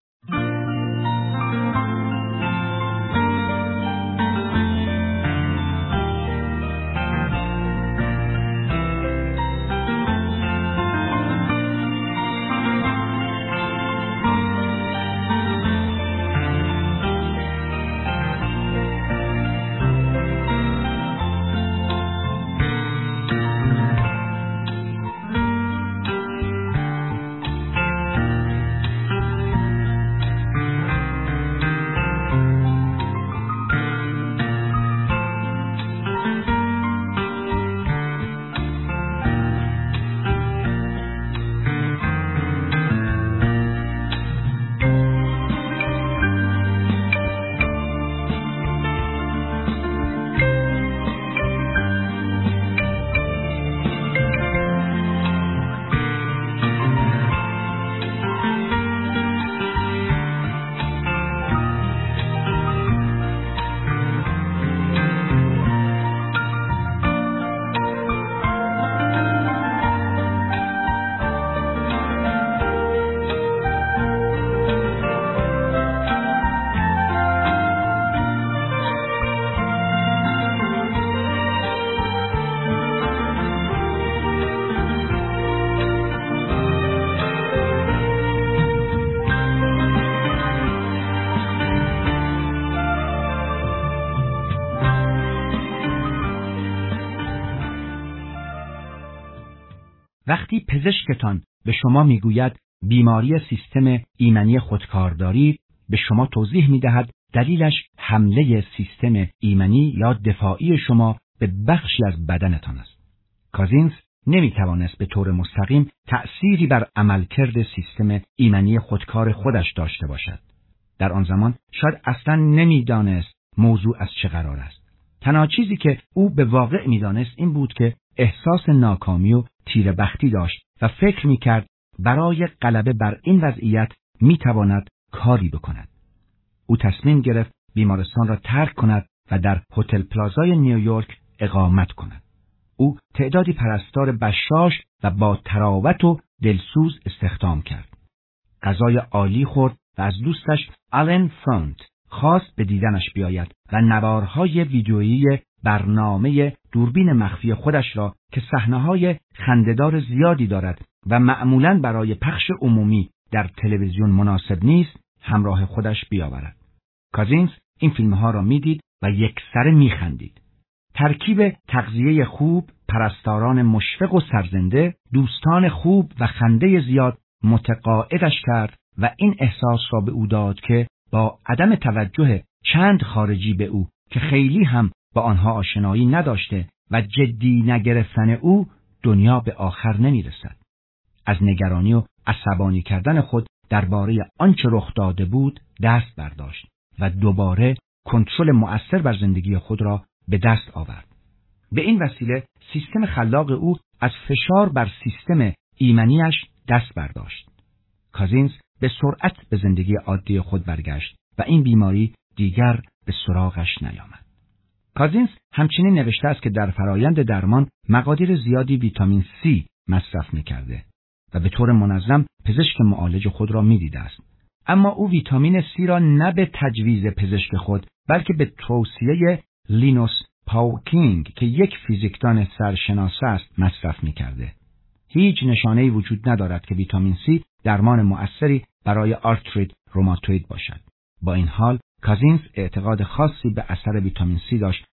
وقتی پزشکتان به شما میگوید بیماری سیستم ایمنی خودکار دارید، به شما توضیح میدهد دلیلش حمله سیستم ایمنی یا دفاعی شما به بخشی از بدنتان است. کازینز نمیتوانست به طور مستقیم تأثیری بر عملکرد سیستم ایمنی خودکار خودش داشته باشد. در آن زمان شاید اصلا نمیدانست موضوع از چه قرار است. تنها چیزی که او به واقع میدانست این بود که احساس ناکامی و تیره‌بختی داشت و فکر میکرد برای غلبه بر این وضعیت میتواند کاری بکند. او تصمیم گرفت بیمارستان را ترک کند و در هتل پلازای نیویورک اقامت کند. او تعدادی پرستار بشاش و با تراوت و دلسوز استخدام کرد. غذای عالی خورد و از دوستش آلن فرانت خواست به دیدنش بیاید و نوارهای ویدیویی برنامه دوربین مخفی خودش را که صحنه‌های خنده‌دار زیادی دارد و معمولاً برای پخش عمومی در تلویزیون مناسب نیست همراه خودش بیاورد. کازینز این فیلمها را میدید و یکسره میخندید. ترکیب تغذیه خوب، پرستاران مشفق و سرزنده، دوستان خوب و خنده زیاد متقاعدش کرد و این احساس را به او داد که با عدم توجه چند خارجی به او که خیلی هم با آنها آشنایی نداشته و جدی نگرفتن او دنیا به آخر نمیرسد. از نگرانی و عصبانی کردن خود درباره آنچه رخ داده بود دست برداشت و دوباره کنترل مؤثر بر زندگی خود را به دست آورد. به این وسیله سیستم خلاق او از فشار بر سیستم ایمنیش دست برداشت. کازینز به سرعت به زندگی عادی خود برگشت و این بیماری دیگر به سراغش نیامد. کازینز همچنین نوشته است که در فرایند درمان مقادیر زیادی ویتامین C مصرف می‌کرده و به طور منظم پزشک معالج خود را می‌دیده است. اما او ویتامین C را نه به تجویز پزشک خود بلکه به توصیه لینوس پاوکینگ که یک فیزیکدان سرشناس است مصرف می‌کرده. هیچ نشانه‌ای وجود ندارد که ویتامین C درمان مؤثری برای آرتریت روماتوید باشد. با این حال کازینز اعتقاد خاصی به اثر ویتامین C داشت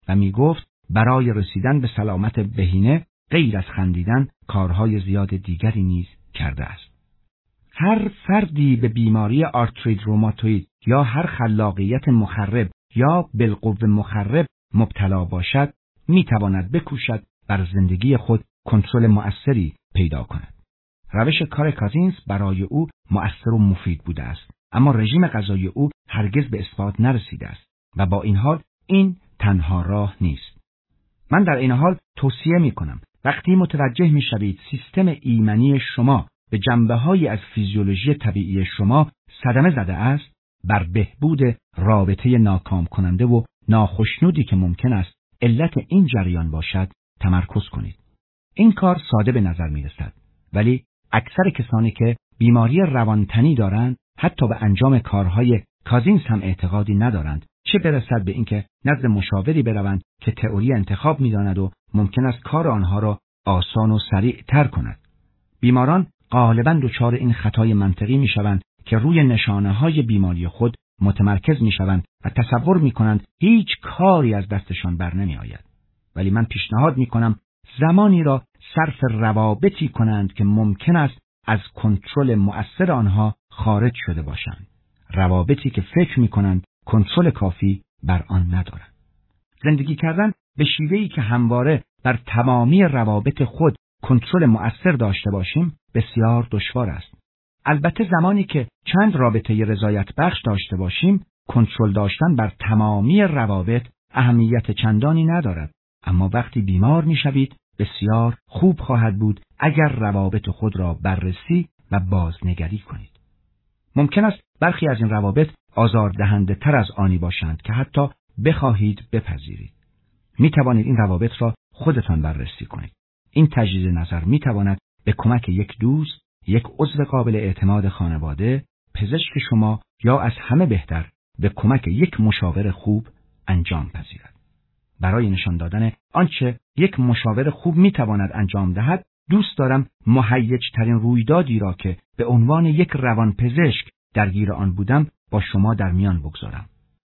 و می گفت برای رسیدن به سلامت بهینه غیر از خندیدن کارهای زیاد دیگری نیز کرده است. هر فردی به بیماری آرتریت روماتوئید یا هر خلاقیت مخرب یا بالقوه مخرب مبتلا باشد می تواند بکوشد بر زندگی خود کنترل مؤثری پیدا کند. روش کار کازینز برای او مؤثر و مفید بوده است، اما رژیم غذایی او هرگز به اثبات نرسیده است و با این حال این تنها راه نیست. من در این حال توصیه می کنم وقتی متوجه می شوید سیستم ایمنی شما به جنبه‌هایی از فیزیولوژی طبیعی شما صدمه زده است، بر بهبود رابطه ناکام کننده و ناخشنودی که ممکن است علت این جریان باشد تمرکز کنید. این کار ساده به نظر می رسد، ولی اکثر کسانی که بیماری روانتنی دارند حتی به انجام کارهای کازینز هم اعتقادی ندارند، چه برسد به اینکه نزد مشاوری بروند که تئوری انتخاب می‌داند و ممکن است کار آنها را آسان و سریع تر کند. بیماران غالباً دچار این خطای منطقی می‌شوند که روی نشانه‌های بیماری خود متمرکز می‌شوند و تصور می‌کنند هیچ کاری از دستشان بر نمی‌آید. ولی من پیشنهاد می‌کنم زمانی را صرف روابطی کنند که ممکن است از کنترل مؤثر آنها خارج شده باشند. روابطی که فکر می‌کنند کنترل کافی بر آن ندارند. زندگی کردن به شیوهی که همواره بر تمامی روابط خود کنترل مؤثر داشته باشیم بسیار دشوار است. البته زمانی که چند رابطه رضایت بخش داشته باشیم، کنترل داشتن بر تمامی روابط اهمیت چندانی ندارد، اما وقتی بیمار می‌شوید بسیار خوب خواهد بود اگر روابط خود را بررسی و بازنگری کنید. ممکن است برخی از این روابط آزاردهنده تر از آنی باشند که حتی بخواهید بپذیرید. می توانید این روابط را خودتان بررسی کنید. این تجدید نظر می تواند به کمک یک دوست، یک عضو قابل اعتماد خانواده، پزشک شما یا از همه بهتر به کمک یک مشاور خوب انجام پذیرد. برای نشان دادن آنچه یک مشاور خوب می تواند انجام دهد، دوست دارم مهیج ترین رویدادی را که به عنوان یک روانپزشک درگیر آن بودم با شما در میان بگذارم.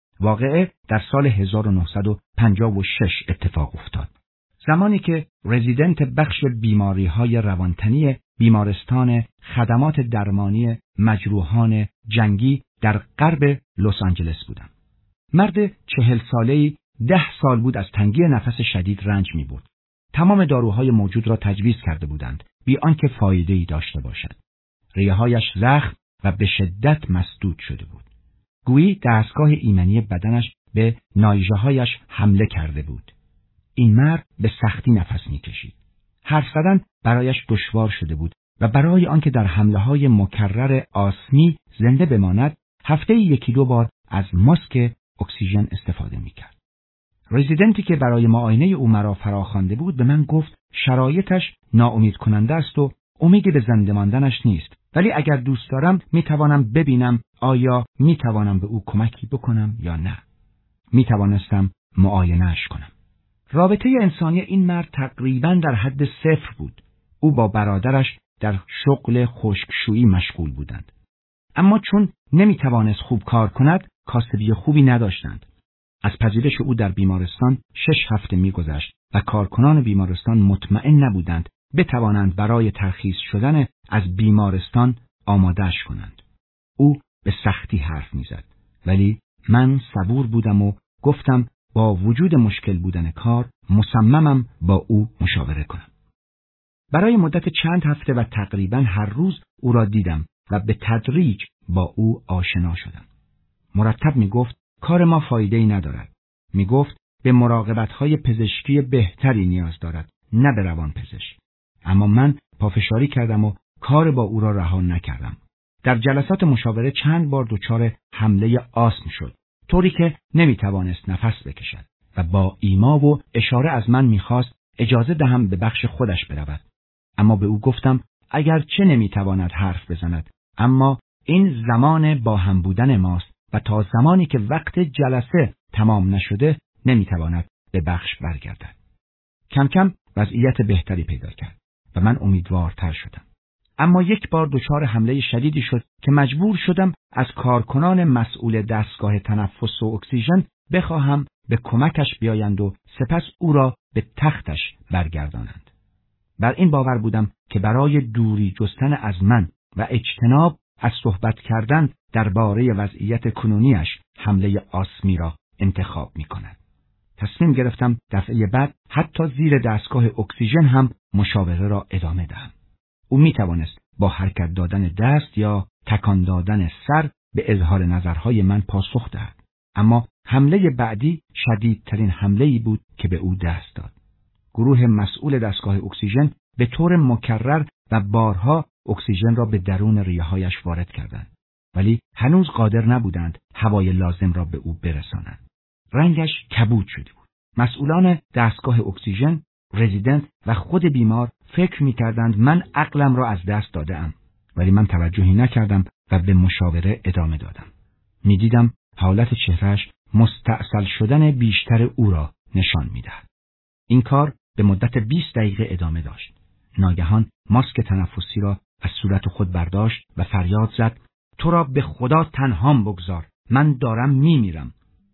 واقعه در سال هزار و نهصد و پنجاه و شش اتفاق افتاد. زمانی که رزیدنت بخش بیماری‌های روانتنی بیمارستان خدمات درمانی مجروحان جنگی در غرب لس آنجلس بودم. مرد چهل ساله‌ای ده سال بود از تنگی نفس شدید رنج می‌برد. تمام داروهای موجود را تجویز کرده بودند بی آنکه فایده‌ای داشته باشد. ریه‌هایش زخم و به شدت مسدود شده بود. گویی دستگاه ایمنی بدنش به نایژه‌هایش حمله کرده بود. این مرد به سختی نفس می‌کشید. حرف زدن برایش دشوار شده بود و برای آنکه در حمله‌های مکرر آسمی زنده بماند، هفته‌ای یکی دو بار از ماسک اکسیژن استفاده می‌کرد. رزیدنتی که برای معاینه او مرا فراخوانده بود به من گفت شرایطش ناامید کننده است و امیدی به زنده ماندنش نیست، ولی اگر دوست دارم میتوانم ببینم آیا میتوانم به او کمکی بکنم یا نه. میتوانستم معاینه‌اش کنم. رابطه انسانی این مرد تقریباً در حد صفر بود. او با برادرش در شغل خشکشویی مشغول بودند. اما چون نمیتوانست خوب کار کند، کاسبی خوبی نداشتند. از پذیرش او در بیمارستان شش هفته میگذشت و کارکنان بیمارستان مطمئن نبودند بتوانند برای ترخیص شدن از بیمارستان آمادهش کنند. او به سختی حرف میزد، ولی من صبور بودم و گفتم با وجود مشکل بودن کار مصممم با او مشاوره کنم. برای مدت چند هفته و تقریبا هر روز او را دیدم و به تدریج با او آشنا شدم. مرتب میگفت کار ما فایده‌ای ندارد. میگفت به مراقبت‌های پزشکی بهتری نیاز دارد، نه به روان پزشک. اما من پافشاری کردم و کار با او را رها نکردم. در جلسات مشاوره چند بار دچار حمله آسم شد، طوری که نمیتوانست نفس بکشد و با ایما و اشاره از من میخواست اجازه دهم به بخش خودش برود. اما به او گفتم اگر چه نمیتواند حرف بزند، اما این زمان با هم بودن ماست و تا زمانی که وقت جلسه تمام نشده نمیتواند به بخش برگردد. کم کم وضعیت بهتری پیدا کرد و من امیدوارتر شدم. اما یک بار دچار حمله شدیدی شد که مجبور شدم از کارکنان مسئول دستگاه تنفس و اکسیژن بخواهم به کمکش بیایند و سپس او را به تختش برگردانند. بر این باور بودم که برای دوری جستن از من و اجتناب از صحبت کردن درباره وضعیت کنونیش حمله آسمی را انتخاب می کند. تصمیم گرفتم دفعه بعد حتی زیر دستگاه اکسیژن هم مشاوره را ادامه دهم. او می توانست با حرکت دادن دست یا تکان دادن سر به اظهار نظرهای من پاسخ دهد. اما حمله بعدی شدیدترین حمله‌ای بود که به او دست داد. گروه مسئول دستگاه اکسیژن به طور مکرر و بارها اکسیژن را به درون ریه‌هایش وارد کردند، ولی هنوز قادر نبودند هوای لازم را به او برسانند. رنگش کبود شده بود. مسئولان دستگاه اکسیژن، رزیدنت و خود بیمار فکر می‌کردند من عقلم را از دست داده‌ام، ولی من توجهی نکردم و به مشاوره ادامه دادم. می‌دیدم حالت چهرهش مستعسل شدن بیشتر او را نشان می‌دهد. این کار به مدت بیست دقیقه ادامه داشت. ناگهان ماسک تنفسی را از صورت خود برداشت و فریاد زد: تو را به خدا تنهام بگذار، من دارم میمیرم.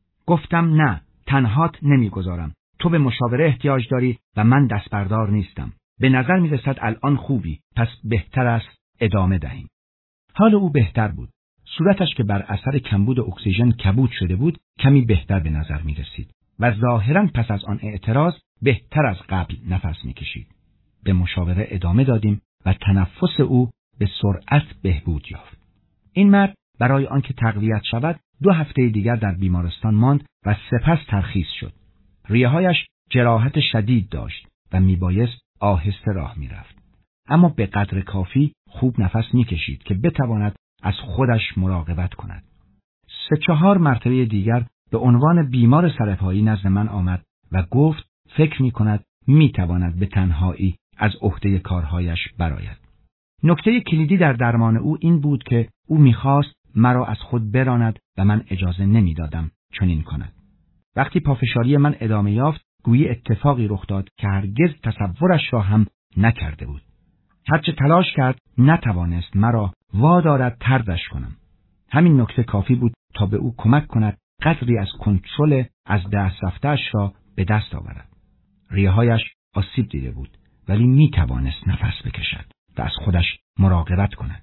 گفتم نه، تنهات نمیگذارم. تو به مشاوره احتیاج داری و من دستبردار نیستم. به نظر میرسد الان خوبی، پس بهتر است ادامه دهیم. حال او بهتر بود. صورتش که بر اثر کمبود اکسیژن کبود شده بود کمی بهتر به نظر می رسید و ظاهراً پس از آن اعتراض بهتر از قبل نفس می کشید. به مشاوره ادامه دادیم و تنفس او به سرعت بهبود یافت. این مرد برای آنکه تقویت شود دو هفته دیگر در بیمارستان ماند و سپس ترخیص شد. ریه‌هایش جراحت شدید داشت و میبایست آهسته راه میرفت، اما به قدر کافی خوب نفس میکشید که بتواند از خودش مراقبت کند. سه چهار مرتبه دیگر به عنوان بیمار سرپایی نزد من آمد و گفت فکر میکند میتواند به تنهایی از عهده کارهایش برآید. نکته کلیدی در درمان او این بود که او میخواست مرا از خود براند و من اجازه نمیدادم چنین کند. وقتی پافشاری من ادامه یافت، گویی اتفاقی رخ داد که هرگز تصورش را هم نکرده بود. هرچه تلاش کرد نتوانست مرا وادارد طردش کنم. همین نکته کافی بود تا به او کمک کند قدری از کنترل از دست رفته‌اش را به دست آورد. ریه‌هایش آسیب دیده بود، ولی می توانست نفس بکشد و از خودش مراقبت کند.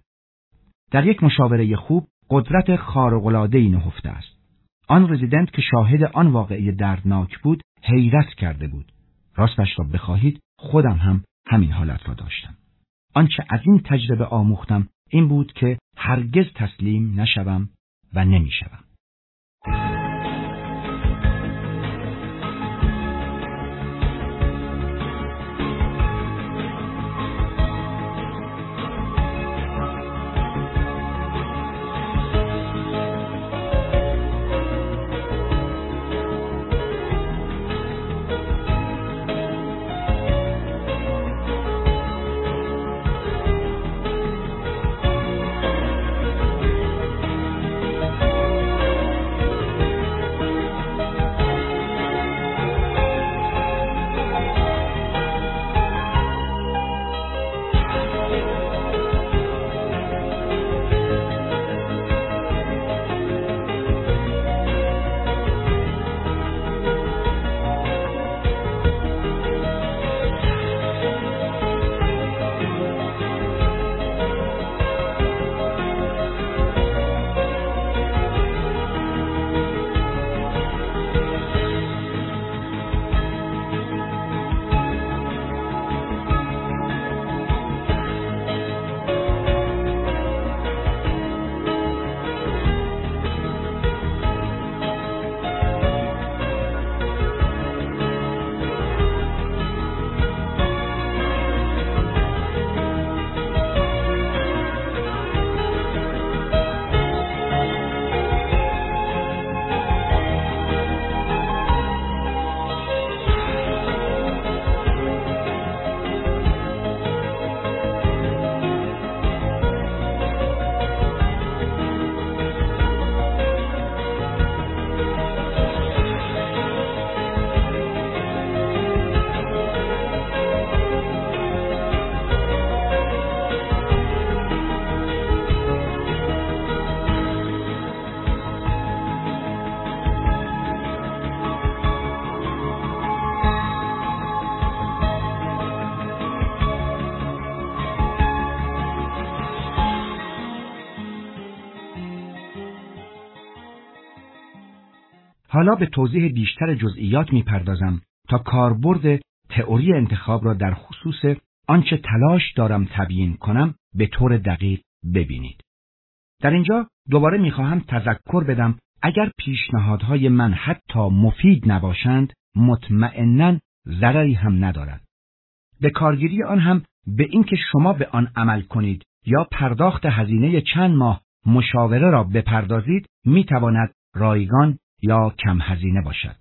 در یک مشاوره خوب قدرت خارق‌العاده‌ای نهفته است. آن رزیدنت که شاهد آن واقعه دردناک بود حیرت کرده بود. راستش را بخواهید خودم هم همین حالت را داشتم. آنچه از این تجربه آموختم این بود که هرگز تسلیم نشوم و نمیشوم. حالا به توضیح بیشتر جزئیات میپردازم تا کاربرد تئوری انتخاب را در خصوص آنچه تلاش دارم تبیین کنم به طور دقیق ببینید. در اینجا دوباره میخواهم تذکر بدم اگر پیشنهادهای من حتی مفید نباشند مطمئناً ضرری هم ندارد. به کارگیری آن هم به اینکه شما به آن عمل کنید یا پرداخت هزینه چند ماه مشاوره را بپردازید میتواند رایگان یا کم هزینه باشد.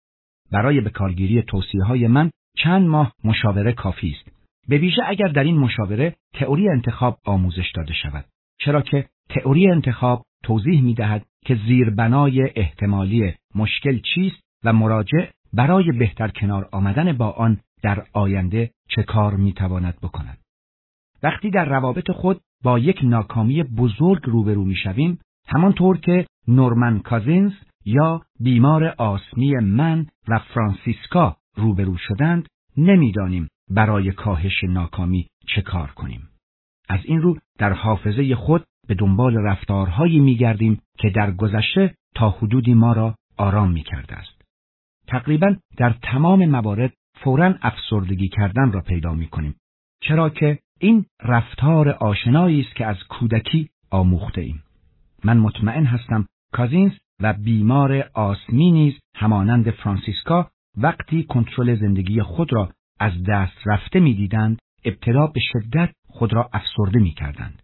برای به کارگیری توصیه‌های من چند ماه مشاوره کافی است. به ویژه اگر در این مشاوره تئوری انتخاب آموزش داده شود. چرا که تئوری انتخاب توضیح می‌دهد که زیربنای احتمالی مشکل چیست و مراجع برای بهتر کنار آمدن با آن در آینده چه کار می‌تواند بکند. وقتی در روابط خود با یک ناکامی بزرگ روبرو می‌شویم، همانطور که نورمن کازینز یا بیمار آسمی من و فرانسیسکا روبرو شدند، نمی‌دانیم برای کاهش ناکامی چه کار کنیم. از این رو در حافظه خود به دنبال رفتارهایی می‌گردیم که در گذشته تا حدودی ما را آرام می‌کرده است. تقریباً در تمام موارد فوراً افسردگی کردن را پیدا می‌کنیم، چرا که این رفتار آشنایی است که از کودکی آموخته ایم. من مطمئن هستم کازینز و بیمار آسمی نیز همانند فرانسیسکا وقتی کنترل زندگی خود را از دست رفته می‌دیدند، ابتدا به شدت خود را افسرده می‌کردند.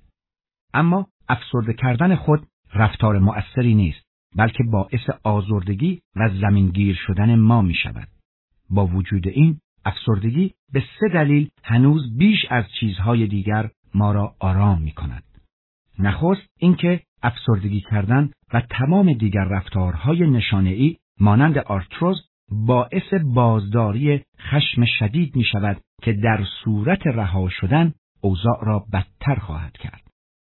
اما افسرده کردن خود رفتار مؤثری نیست، بلکه باعث آزردگی و زمینگیر شدن ما می‌شود. با وجود این، افسردگی به سه دلیل هنوز بیش از چیزهای دیگر ما را آرام می‌کند. نخست اینکه افسردگی کردن و تمام دیگر رفتارهای نشانه‌ای مانند آرتروز باعث بازداری خشم شدید می شود که در صورت رها شدن اوضاع را بدتر خواهد کرد.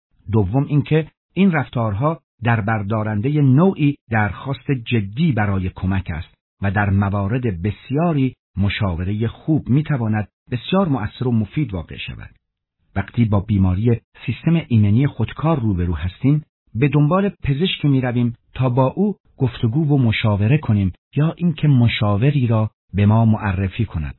دوم اینکه این رفتارها در بردارنده نوعی درخواست جدی برای کمک است و در موارد بسیاری مشاوره خوب می تواند بسیار مؤثر و مفید واقع شود. وقتی با بیماری سیستم ایمنی خودکار روبرو هستیم، به دنبال پزشکی می رویم تا با او گفتگو و مشاوره کنیم یا اینکه مشاوری را به ما معرفی کند.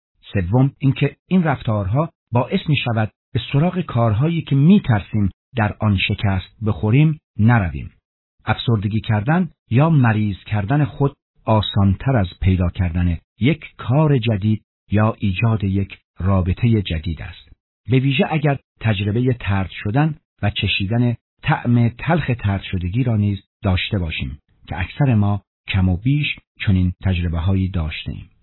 سوم اینکه این رفتارها باعث می شود به سراغ کارهایی که می ترسیم در آن شکست بخوریم نرویم. افسردگی کردن یا مریض کردن خود آسانتر از پیدا کردن یک کار جدید یا ایجاد یک رابطه جدید است. به ویژه اگر تجربه طرد شدن و چشیدن طعم تلخ طرد شدگی را نیز داشته باشیم که اکثر ما کم و بیش چنین تجربه هایی داشته ایم.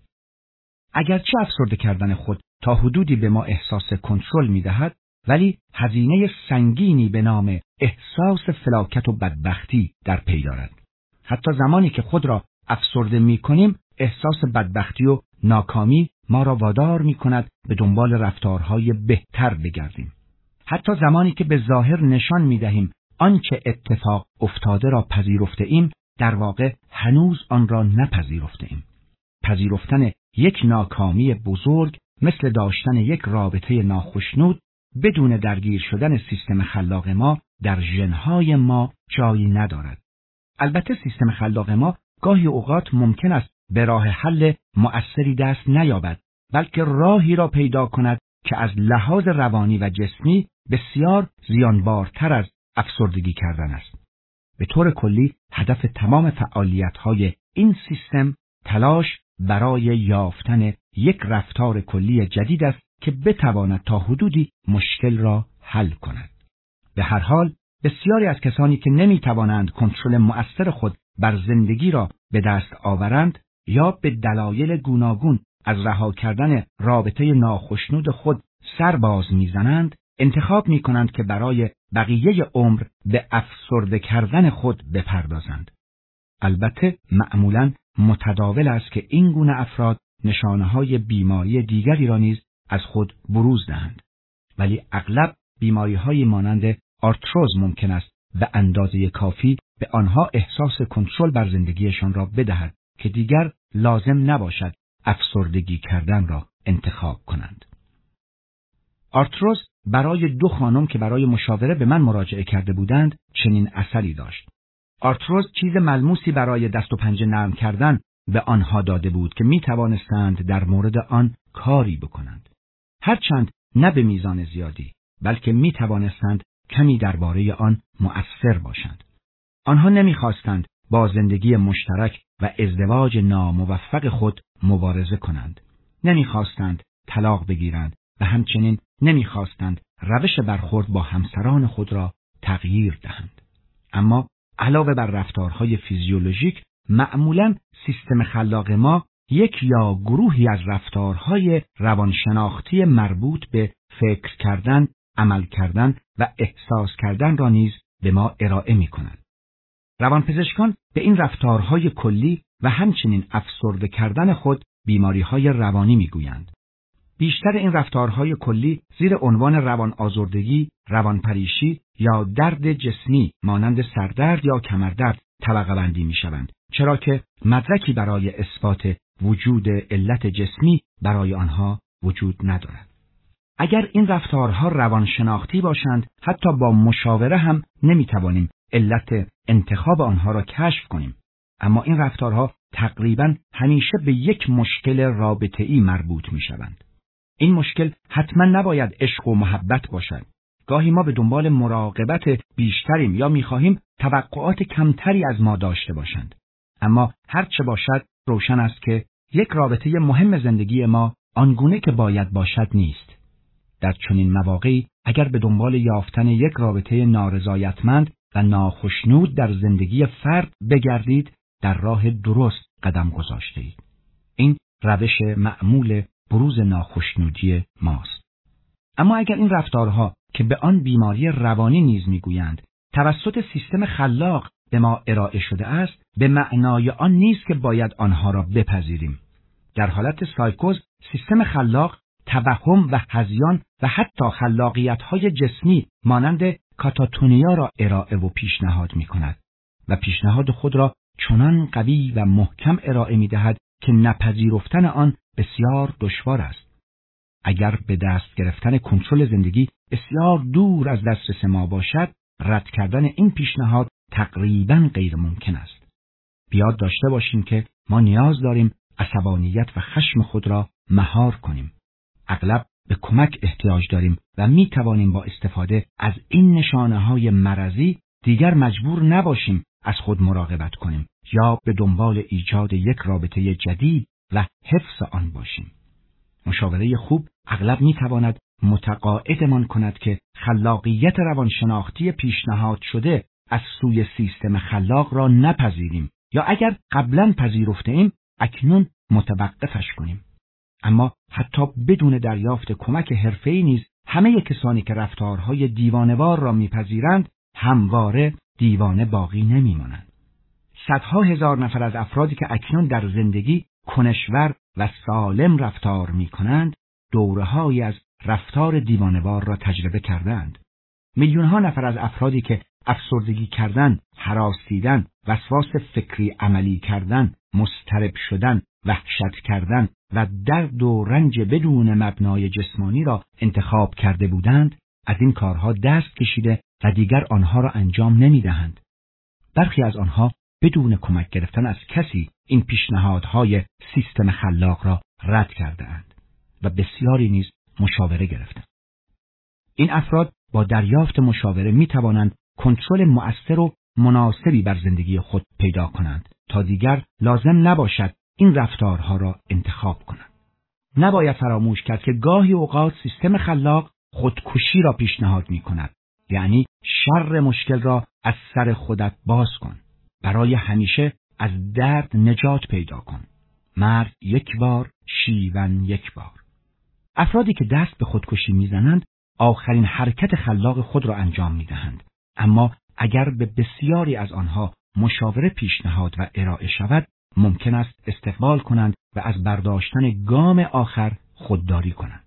اگرچه افسرده کردن خود تا حدودی به ما احساس کنترل می دهد، ولی هزینه سنگینی به نام احساس فلاکت و بدبختی در پی دارد. حتی زمانی که خود را افسرده می کنیم، احساس بدبختی و ناکامی ما را وادار می کند به دنبال رفتارهای بهتر بگردیم. حتی زمانی که به ظاهر نشان می دهیم آنچه اتفاق افتاده را پذیرفته ایم، در واقع هنوز آن را نپذیرفته ایم. پذیرفتن یک ناکامی بزرگ مثل داشتن یک رابطه ناخوشنود بدون درگیر شدن سیستم خلاق ما در ژن‌های ما جایی ندارد. البته سیستم خلاق ما گاهی اوقات ممکن است به راه حل مؤثری دست نیابد، بلکه راهی را پیدا کند که از لحاظ روانی و جسمی بسیار زیانبارتر از افسردگی کردن است. به طور کلی هدف تمام فعالیت‌های این سیستم تلاش برای یافتن یک رفتار کلی جدید است که بتواند تا حدودی مشکل را حل کند. به هر حال بسیاری از کسانی که نمی‌توانند کنترل مؤثر خود بر زندگی را به دست آورند یا به دلایل گوناگون از رها کردن رابطه ناخوشنود خود سر باز می‌زنند، انتخاب می‌کنند که برای بقیه عمر به افسرده کردن خود بپردازند. البته معمولاً متداول است که این گونه افراد نشانه‌های بیماری دیگری را نیز از خود بروز دهند، ولی اغلب بیماری‌های مانند آرتروز ممکن است به اندازه کافی به آنها احساس کنترل بر زندگیشان را بدهد که دیگر لازم نباشد افسردگی کردن را انتخاب کنند. آرتروز برای دو خانم که برای مشاوره به من مراجعه کرده بودند چنین اثری داشت. آرتروز چیز ملموسی برای دست و پنجه نرم کردن به آنها داده بود که می توانستند در مورد آن کاری بکنند. هرچند نه به میزان زیادی، بلکه می توانستند کمی درباره آن مؤثر باشند. آنها نمی خواستند با زندگی مشترک و ازدواج ناموفق خود مبارزه کنند. نمی خواستند طلاق بگیرند و همچنین نمی خواستند روش برخورد با همسران خود را تغییر دهند. اما علاوه بر رفتارهای فیزیولوژیک، معمولاً سیستم خلاق ما یک یا گروهی از رفتارهای روانشناختی مربوط به فکر کردن، عمل کردن و احساس کردن را نیز به ما ارائه می کنند. روانپزشکان به این رفتارهای کلی و همچنین افسرده کردن خود بیماریهای روانی می گویند. بیشتر این رفتارهای کلی زیر عنوان روان آزردگی، روانپریشی یا درد جسمی مانند سردرد یا کمردرد طبقه بندی می شوند، چرا که مدرکی برای اثبات وجود علت جسمی برای آنها وجود ندارد. اگر این رفتارها روانشناختی باشند، حتی با مشاوره هم نمی توانیم علت انتخاب آنها را کشف کنیم. اما این رفتارها تقریباً همیشه به یک مشکل رابطه‌ای مربوط می شوند. این مشکل حتما نباید عشق و محبت باشد. گاهی ما به دنبال مراقبت بیشتریم یا می‌خواهیم توقعات کمتری از ما داشته باشند. اما هر چه باشد روشن است که یک رابطه مهم زندگی ما آنگونه که باید باشد نیست. در چنین مواقعی اگر به دنبال یافتن یک رابطه نارضایتمند و ناخشنود در زندگی فرد بگردید، در راه درست قدم گذاشتید. این روش معمول بروز ناخشنودی ماست. اما اگر این رفتارها که به آن بیماری روانی نیز میگویند توسط سیستم خلاق به ما ارائه شده است، به معنای آن نیست که باید آنها را بپذیریم. در حالت سایکوز، سیستم خلاق توهم و هذیان و حتی خلاقیت‌های جسمی مانند کاتاتونیا را ارائه و پیشنهاد می‌کند و پیشنهاد خود را چنان قوی و محکم ارائه می‌دهد که نپذیرفتن آن بسیار دشوار است. اگر به دست گرفتن کنترل زندگی بسیار دور از دسترس ما باشد، رد کردن این پیشنهاد تقریباً غیر ممکن است. بیاد داشته باشیم که ما نیاز داریم عصبانیت و خشم خود را مهار کنیم. اغلب به کمک احتیاج داریم و می توانیم با استفاده از این نشانه‌های مرضی دیگر مجبور نباشیم از خود مراقبت کنیم یا به دنبال ایجاد یک رابطه جدید و حفظ آن باشیم. مشاوره خوب اغلب می تواند متقاعدمان کند که خلاقیت روانشناختی پیشنهاد شده از سوی سیستم خلاق را نپذیریم یا اگر قبلا پذیرفته ایم اکنون متوقفش کنیم. اما حتی بدون دریافت کمک حرفه‌ای نیز همه کسانی که رفتارهای دیوانه‌وار را میپذیرند همواره دیوانه باقی نمیمانند. صدها هزار نفر از افرادی که اکنون در زندگی کنشور و سالم رفتار میکنند دوره‌هایی از رفتار دیوانه‌وار را تجربه کردند. میلیون‌ها نفر از افرادی که افسردگی کردن، هراس دیدن، وسواس فکری عملی کردن، مضطرب شدن، وحشت کردن و درد و رنج بدون مبنای جسمانی را انتخاب کرده بودند، از این کارها دست کشیده و دیگر آنها را انجام نمی‌دهند. برخی از آنها بدون کمک گرفتن از کسی این پیشنهادهای سیستم خلاق را رد کرده‌اند و بسیاری نیز مشاوره گرفتند. این افراد با دریافت مشاوره می توانند کنترل مؤثر و مناسبی بر زندگی خود پیدا کنند تا دیگر لازم نباشد این رفتارها را انتخاب کنند. نباید فراموش کرد که گاهی اوقات سیستم خلاق خودکشی را پیشنهاد می کند. یعنی شر مشکل را از سر خودت باز کن. برای همیشه از درد نجات پیدا کن. مرگ یک بار، شیون یک بار. افرادی که دست به خودکشی میزنند آخرین حرکت خلاق خود را انجام میدهند. اما اگر به بسیاری از آنها مشاوره پیشنهاد و ارائه شود، ممکن است استقبال کنند و از برداشتن گام آخر خودداری کنند.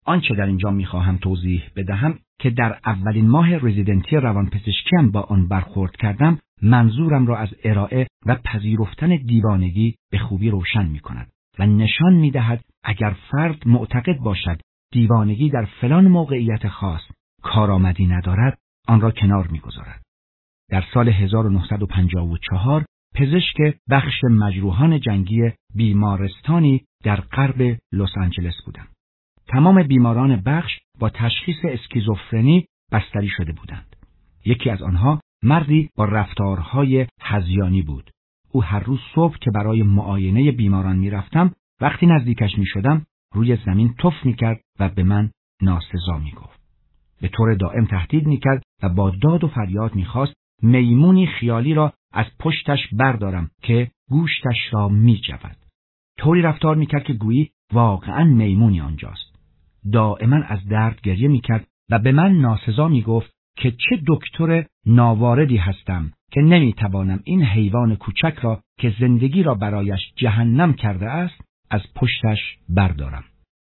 آنچه در اینجا میخواهم توضیح بدهم که در اولین ماه رزیدنتی روانپزشکیم با آن برخورد کردم، منظورم را از ارائه و پذیرفتن دیوانگی به خوبی روشن میکند و نشان میدهد اگر فرد معتقد باشد دیوانگی در فلان موقعیت خاص کارآمدی ندارد، آن را کنار میگذارد. در سال هزار و نهصد و پنجاه و چهار پزشک بخش مجروحان جنگی بیمارستانی در غرب لس آنجلس بودم. تمام بیماران بخش با تشخیص اسکیزوفرنی بستری شده بودند. یکی از آنها مردی با رفتارهای هذیانی بود. او هر روز صبح که برای معاینه بیماران میرفتم، وقتی نزدیکش میشدم روی زمین تف میکرد و به من ناسزا میگفت. به طور دائم تهدید میکرد و با داد و فریاد میخواست میمونی خیالی را از پشتش بردارم که گوشتش را میجود. طوری رفتار میکرد که گویی واقعا میمونی آنجاست. دائما از درد گریه میکرد و به من ناسزا میگفت که چه دکتر ناواردی هستم که نمیتوانم این حیوان کوچک را که زندگی را برایش جهنم کرده است از پشتش بردارم.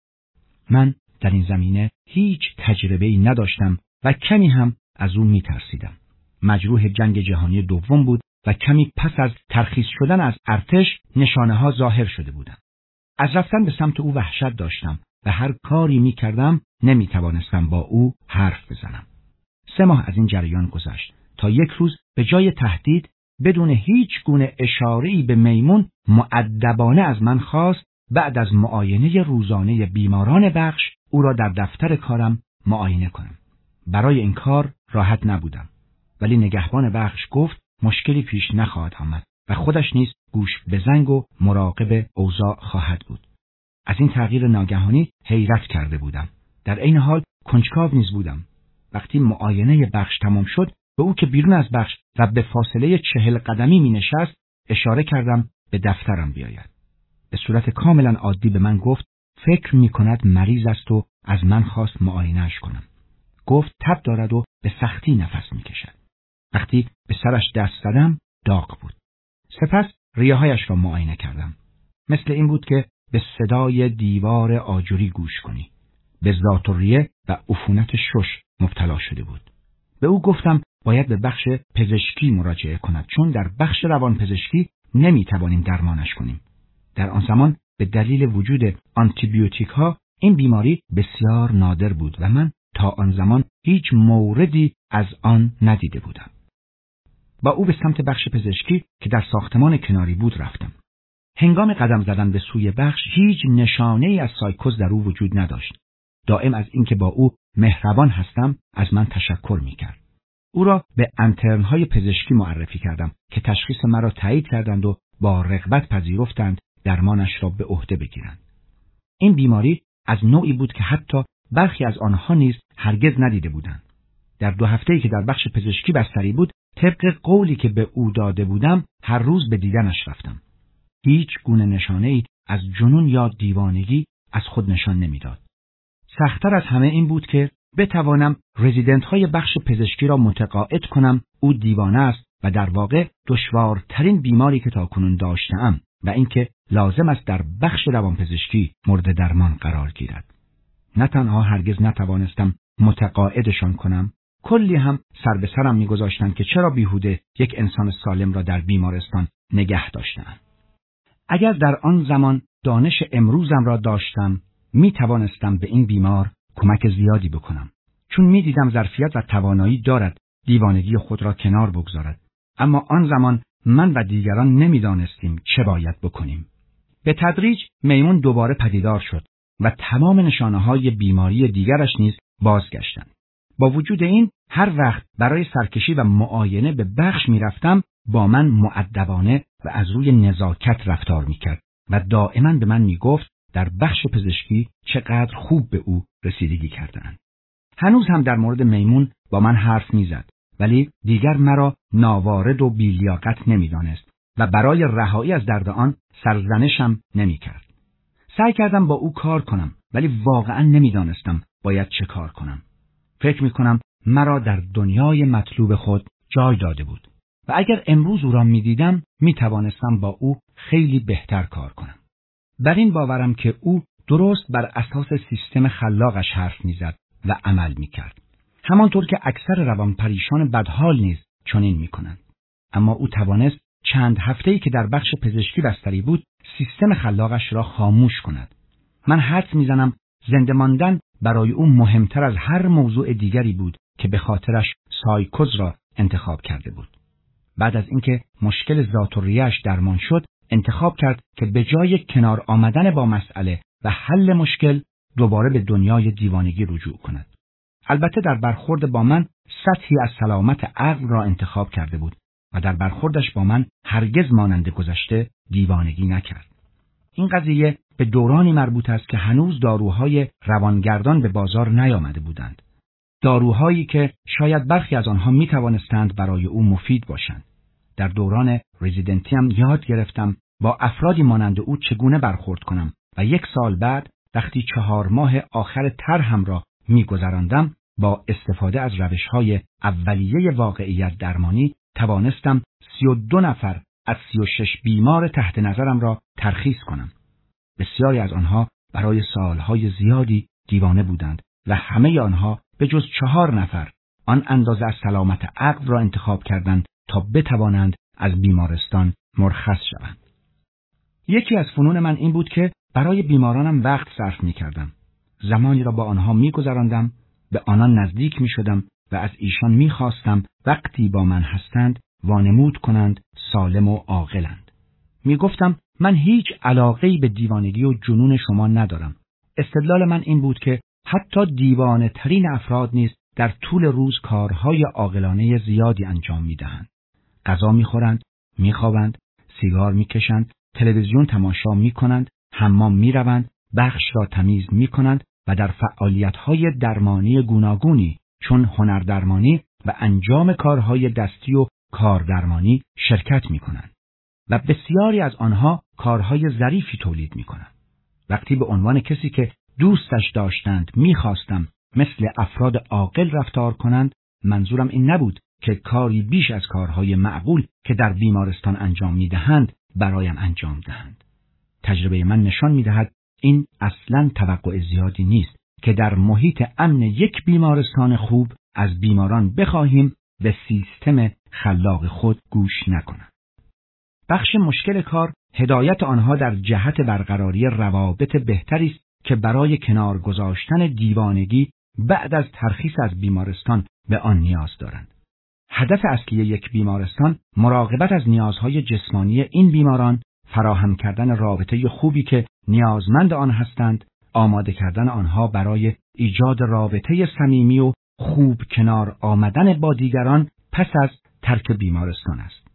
من در این زمینه هیچ تجربه‌ای نداشتم و کمی هم از او میترسیدم. مجروح جنگ جهانی دوم بود و کمی پس از ترخیص شدن از ارتش نشانه ها ظاهر شده بودند. از رفتن به سمت او وحشت داشتم و هر کاری می کردم نمی توانستم با او حرف بزنم. سه ماه از این جریان گذشت تا یک روز به جای تهدید بدون هیچ گونه اشاره‌ای به میمون مؤدبانه از من خواست بعد از معاینه روزانه بیماران بخش او را در دفتر کارم معاینه کنم. برای این کار راحت نبودم، ولی نگهبان بخش گفت مشکلی پیش نخواهد آمد و خودش نیز گوش به زنگ و مراقب اوضاع خواهد بود. از این تغییر ناگهانی حیرت کرده بودم. در عین حال کنجکاو نیز بودم. وقتی معاینه بخش تمام شد، به او که بیرون از بخش و به فاصله چهل قدمی می نشست اشاره کردم به دفترم بیاید. به صورت کاملا عادی به من گفت فکر می کند مریض است و از من خواست معاینه‌اش کنم. گفت تب دارد و به سختی نفس می کشد. وقتی به سرش دست زدم داغ بود. سپس ریه‌هایش را معاینه کردم. مثل این بود که به صدای دیوار آجوری گوش کنی. به ذات‌الریه و عفونت شش مبتلا شده بود. به او گفتم باید به بخش پزشکی مراجعه کند چون در بخش روانپزشکی نمیتوانیم درمانش کنیم. در آن زمان به دلیل وجود آنتیبیوتیک ها این بیماری بسیار نادر بود و من تا آن زمان هیچ موردی از آن ندیده بودم. با او به سمت بخش پزشکی که در ساختمان کناری بود رفتم. هنگام قدم زدن به سوی بخش هیچ نشانه‌ای از سایکوز در او وجود نداشت. دائم از اینکه با او مهربان هستم از من تشکر می‌کرد. او را به انترن‌های پزشکی معرفی کردم که تشخیص مرا تایید کردند و با رغبت پذیرفتند درمانش را به عهده بگیرند. این بیماری از نوعی بود که حتی برخی از آنها نیز هرگز ندیده بودند. در دو هفته‌ای که در بخش پزشکی بستری بود، طبق قولی که به او داده بودم، هر روز به دیدنش رفتم. هیچ گونه نشانه‌ای از جنون یا دیوانگی از خود نشان نمیداد. سخت‌تر از همه این بود که بتوانم رزیدنت‌های بخش پزشکی را متقاعد کنم او دیوانه است و در واقع دشوارترین بیماری که تاکنون داشته‌ام و اینکه لازم است در بخش روانپزشکی مورد درمان قرار گیرد. نه تنها هرگز نتوانستم متقاعدشان کنم، کلی هم سر به سرم می‌گذاشتند که چرا بیهوده یک انسان سالم را در بیمارستان نگه داشتند. اگر در آن زمان دانش امروزم را داشتم، می توانستم به این بیمار کمک زیادی بکنم. چون می دیدم ظرفیت و توانایی دارد دیوانگی خود را کنار بگذارد. اما آن زمان من و دیگران نمی دانستیم چه باید بکنیم. به تدریج میمون دوباره پدیدار شد و تمام نشانه های بیماری دیگرش نیز بازگشتند. با وجود این هر وقت برای سرکشی و معاینه به بخش می رفتم با من مؤدبانه و از روی نزاکت رفتار می کرد و دائما به من می گفت در بخش پزشکی چقدر خوب به او رسیدگی کردند. هنوز هم در مورد میمون با من حرف می زد ولی دیگر مرا ناوارد و بی‌لیاقت نمی دانست و برای رهایی از درد آن سرزنشم نمی کرد. سعی کردم با او کار کنم ولی واقعا نمی دانستم باید چه کار کنم. فکر می کنم مرا در دنیای مطلوب خود جای داده بود و اگر امروز او را می دیدم می توانستم با او خیلی بهتر کار کنم. بر این باورم که او درست بر اساس سیستم خلاقش حرف میزد و عمل میکرد. همانطور که اکثر روانپریشان بدحال نیز چنین میکنند. اما او توانست چند هفته‌ای که در بخش پزشکی بستری بود، سیستم خلاقش را خاموش کند. من حدس میزنم زنده ماندن برای او مهمتر از هر موضوع دیگری بود که به خاطرش سایکوز را انتخاب کرده بود. بعد از اینکه مشکل ذات‌الریه‌اش درمان شد، انتخاب کرد که به جای کنار آمدن با مسئله و حل مشکل، دوباره به دنیای دیوانگی رجوع کند. البته در برخورد با من سطحی از سلامت عقل را انتخاب کرده بود و در برخوردش با من هرگز مانند گذشته دیوانگی نکرد. این قضیه به دورانی مربوط است که هنوز داروهای روانگردان به بازار نیامده بودند. داروهایی که شاید برخی از آنها می توانستند برای او مفید باشند. در دوران رزیدنتیم یاد گرفتم با افرادی مانند او چگونه برخورد کنم و یک سال بعد وقتی چهار ماه آخر طرحم را می گذراندم، با استفاده از روش‌های اولیه واقعیت درمانی توانستم سی و دو نفر از سی و شش بیمار تحت نظرم را ترخیص کنم. بسیاری از آنها برای سالهای زیادی دیوانه بودند و همه آنها به جز چهار نفر آن اندازه از سلامت عقل را انتخاب کردند تا بتوانند از بیمارستان مرخص شوند. یکی از فنون من این بود که برای بیمارانم وقت صرف می کردم. زمانی را با آنها می گذراندم، به آنان نزدیک می شدم و از ایشان می خواستم وقتی با من هستند وانمود کنند سالم و عاقلند. می گفتم من هیچ علاقه‌ای به دیوانگی و جنون شما ندارم. استدلال من این بود که حتی دیوانه ترین افراد نیز در طول روز کارهای عاقلانه زیادی انجام می دهند. غذا می خورند، می خوابند، سیگار می کشند، تلویزیون تماشا می کنند، حمام می روند، بخش را تمیز می کنند و در فعالیت‌های درمانی گوناگونی چون هنردرمانی و انجام کارهای دستی و کاردرمانی شرکت می کنند و بسیاری از آنها کارهای ظریفی تولید می کنند. وقتی به عنوان کسی که دوستش داشتند می خواستم مثل افراد عاقل رفتار کنند، منظورم این نبود که کاری بیش از کارهای معقول که در بیمارستان انجام می دهند برایم انجام دهند. تجربه من نشان می دهد این اصلاً توقع زیادی نیست که در محیط امن یک بیمارستان خوب از بیماران بخواهیم به سیستم خلاق خود گوش نکنند. بخش مشکل کار هدایت آنها در جهت برقراری روابط بهتری است که برای کنار گذاشتن دیوانگی بعد از ترخیص از بیمارستان به آن نیاز دارند. هدف اصلی یک بیمارستان مراقبت از نیازهای جسمانی این بیماران، فراهم کردن رابطه خوبی که نیازمند آن هستند، آماده کردن آنها برای ایجاد رابطه صمیمی و خوب کنار آمدن با دیگران پس از ترک بیمارستان است.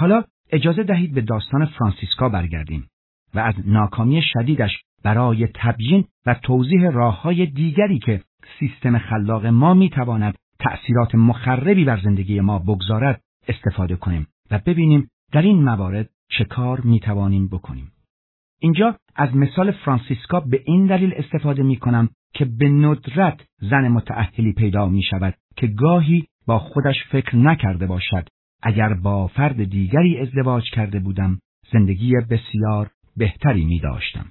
حالا اجازه دهید به داستان فرانسیسکا برگردیم و از ناکامی شدیدش برای تبیین و توضیح راه‌های دیگری که سیستم خلاق ما می‌تواند تأثیرات مخربی بر زندگی ما بگذارد استفاده کنیم و ببینیم در این موارد چه کار می‌توانیم بکنیم. اینجا از مثال فرانسیسکا به این دلیل استفاده می‌کنم که به ندرت زن متأهلی پیدا می‌شود که گاهی با خودش فکر نکرده باشد اگر با فرد دیگری ازدواج کرده بودم زندگی بسیار بهتری می‌داشتم.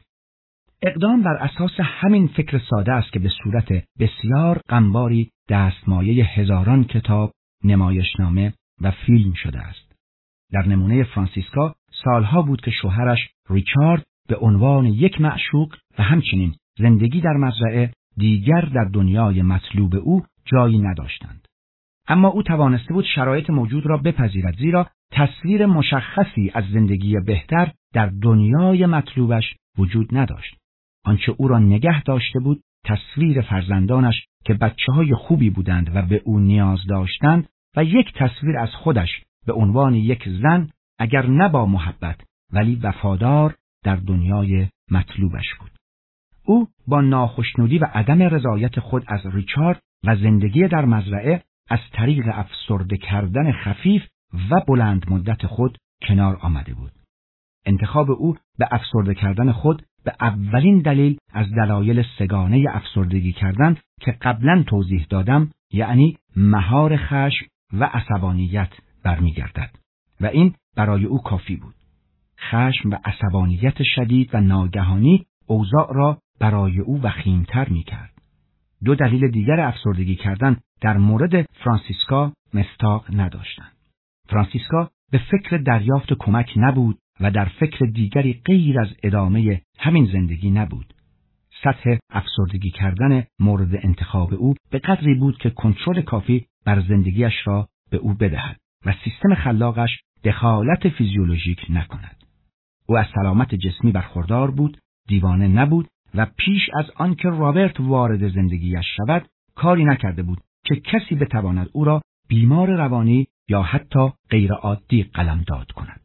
اقدام بر اساس همین فکر ساده است که به صورت بسیار غمباری دستمایه هزاران کتاب، نمایشنامه و فیلم شده است. در نمونه فرانسیسکا سالها بود که شوهرش ریچارد به عنوان یک معشوق و همچنین زندگی در مزرعه دیگر در دنیای مطلوب او جایی نداشتند. اما او توانسته بود شرایط موجود را بپذیرد، زیرا تصویر مشخصی از زندگی بهتر در دنیای مطلوبش وجود نداشت. آنچه او را نگه داشته بود تصویر فرزندانش که بچه‌های خوبی بودند و به او نیاز داشتند و یک تصویر از خودش به عنوان یک زن اگر نه با محبت ولی وفادار در دنیای مطلوبش بود. او با ناخشنودی و عدم رضایت خود از ریچارد و زندگی در مزرعه از طریق افسرده کردن خفیف و بلند مدت خود کنار آمده بود. انتخاب او به افسرده کردن خود به اولین دلیل از دلایل سگانه افسردگی کردن که قبلا توضیح دادم، یعنی مهار خشم و عصبانیت برمیگردد و این برای او کافی بود. خشم و عصبانیت شدید و ناگهانی اوضاع را برای او وخیم‌تر می‌کرد. دو دلیل دیگر افسردگی کردن در مورد فرانسیسکا مستاق نداشتند. فرانسیسکا به فکر دریافت کمک نبود و در فکر دیگری غیر از ادامه همین زندگی نبود. سطح افسردگی کردن مورد انتخاب او به قدری بود که کنترل کافی بر زندگیش را به او بدهد و سیستم خلاقش دخالت فیزیولوژیک نکند. او از سلامت جسمی برخوردار بود، دیوانه نبود و پیش از آنکه رابرت وارد زندگیش شود کاری نکرده بود که کسی بتواند او را بیمار روانی یا حتی غیر عادی قلمداد کند.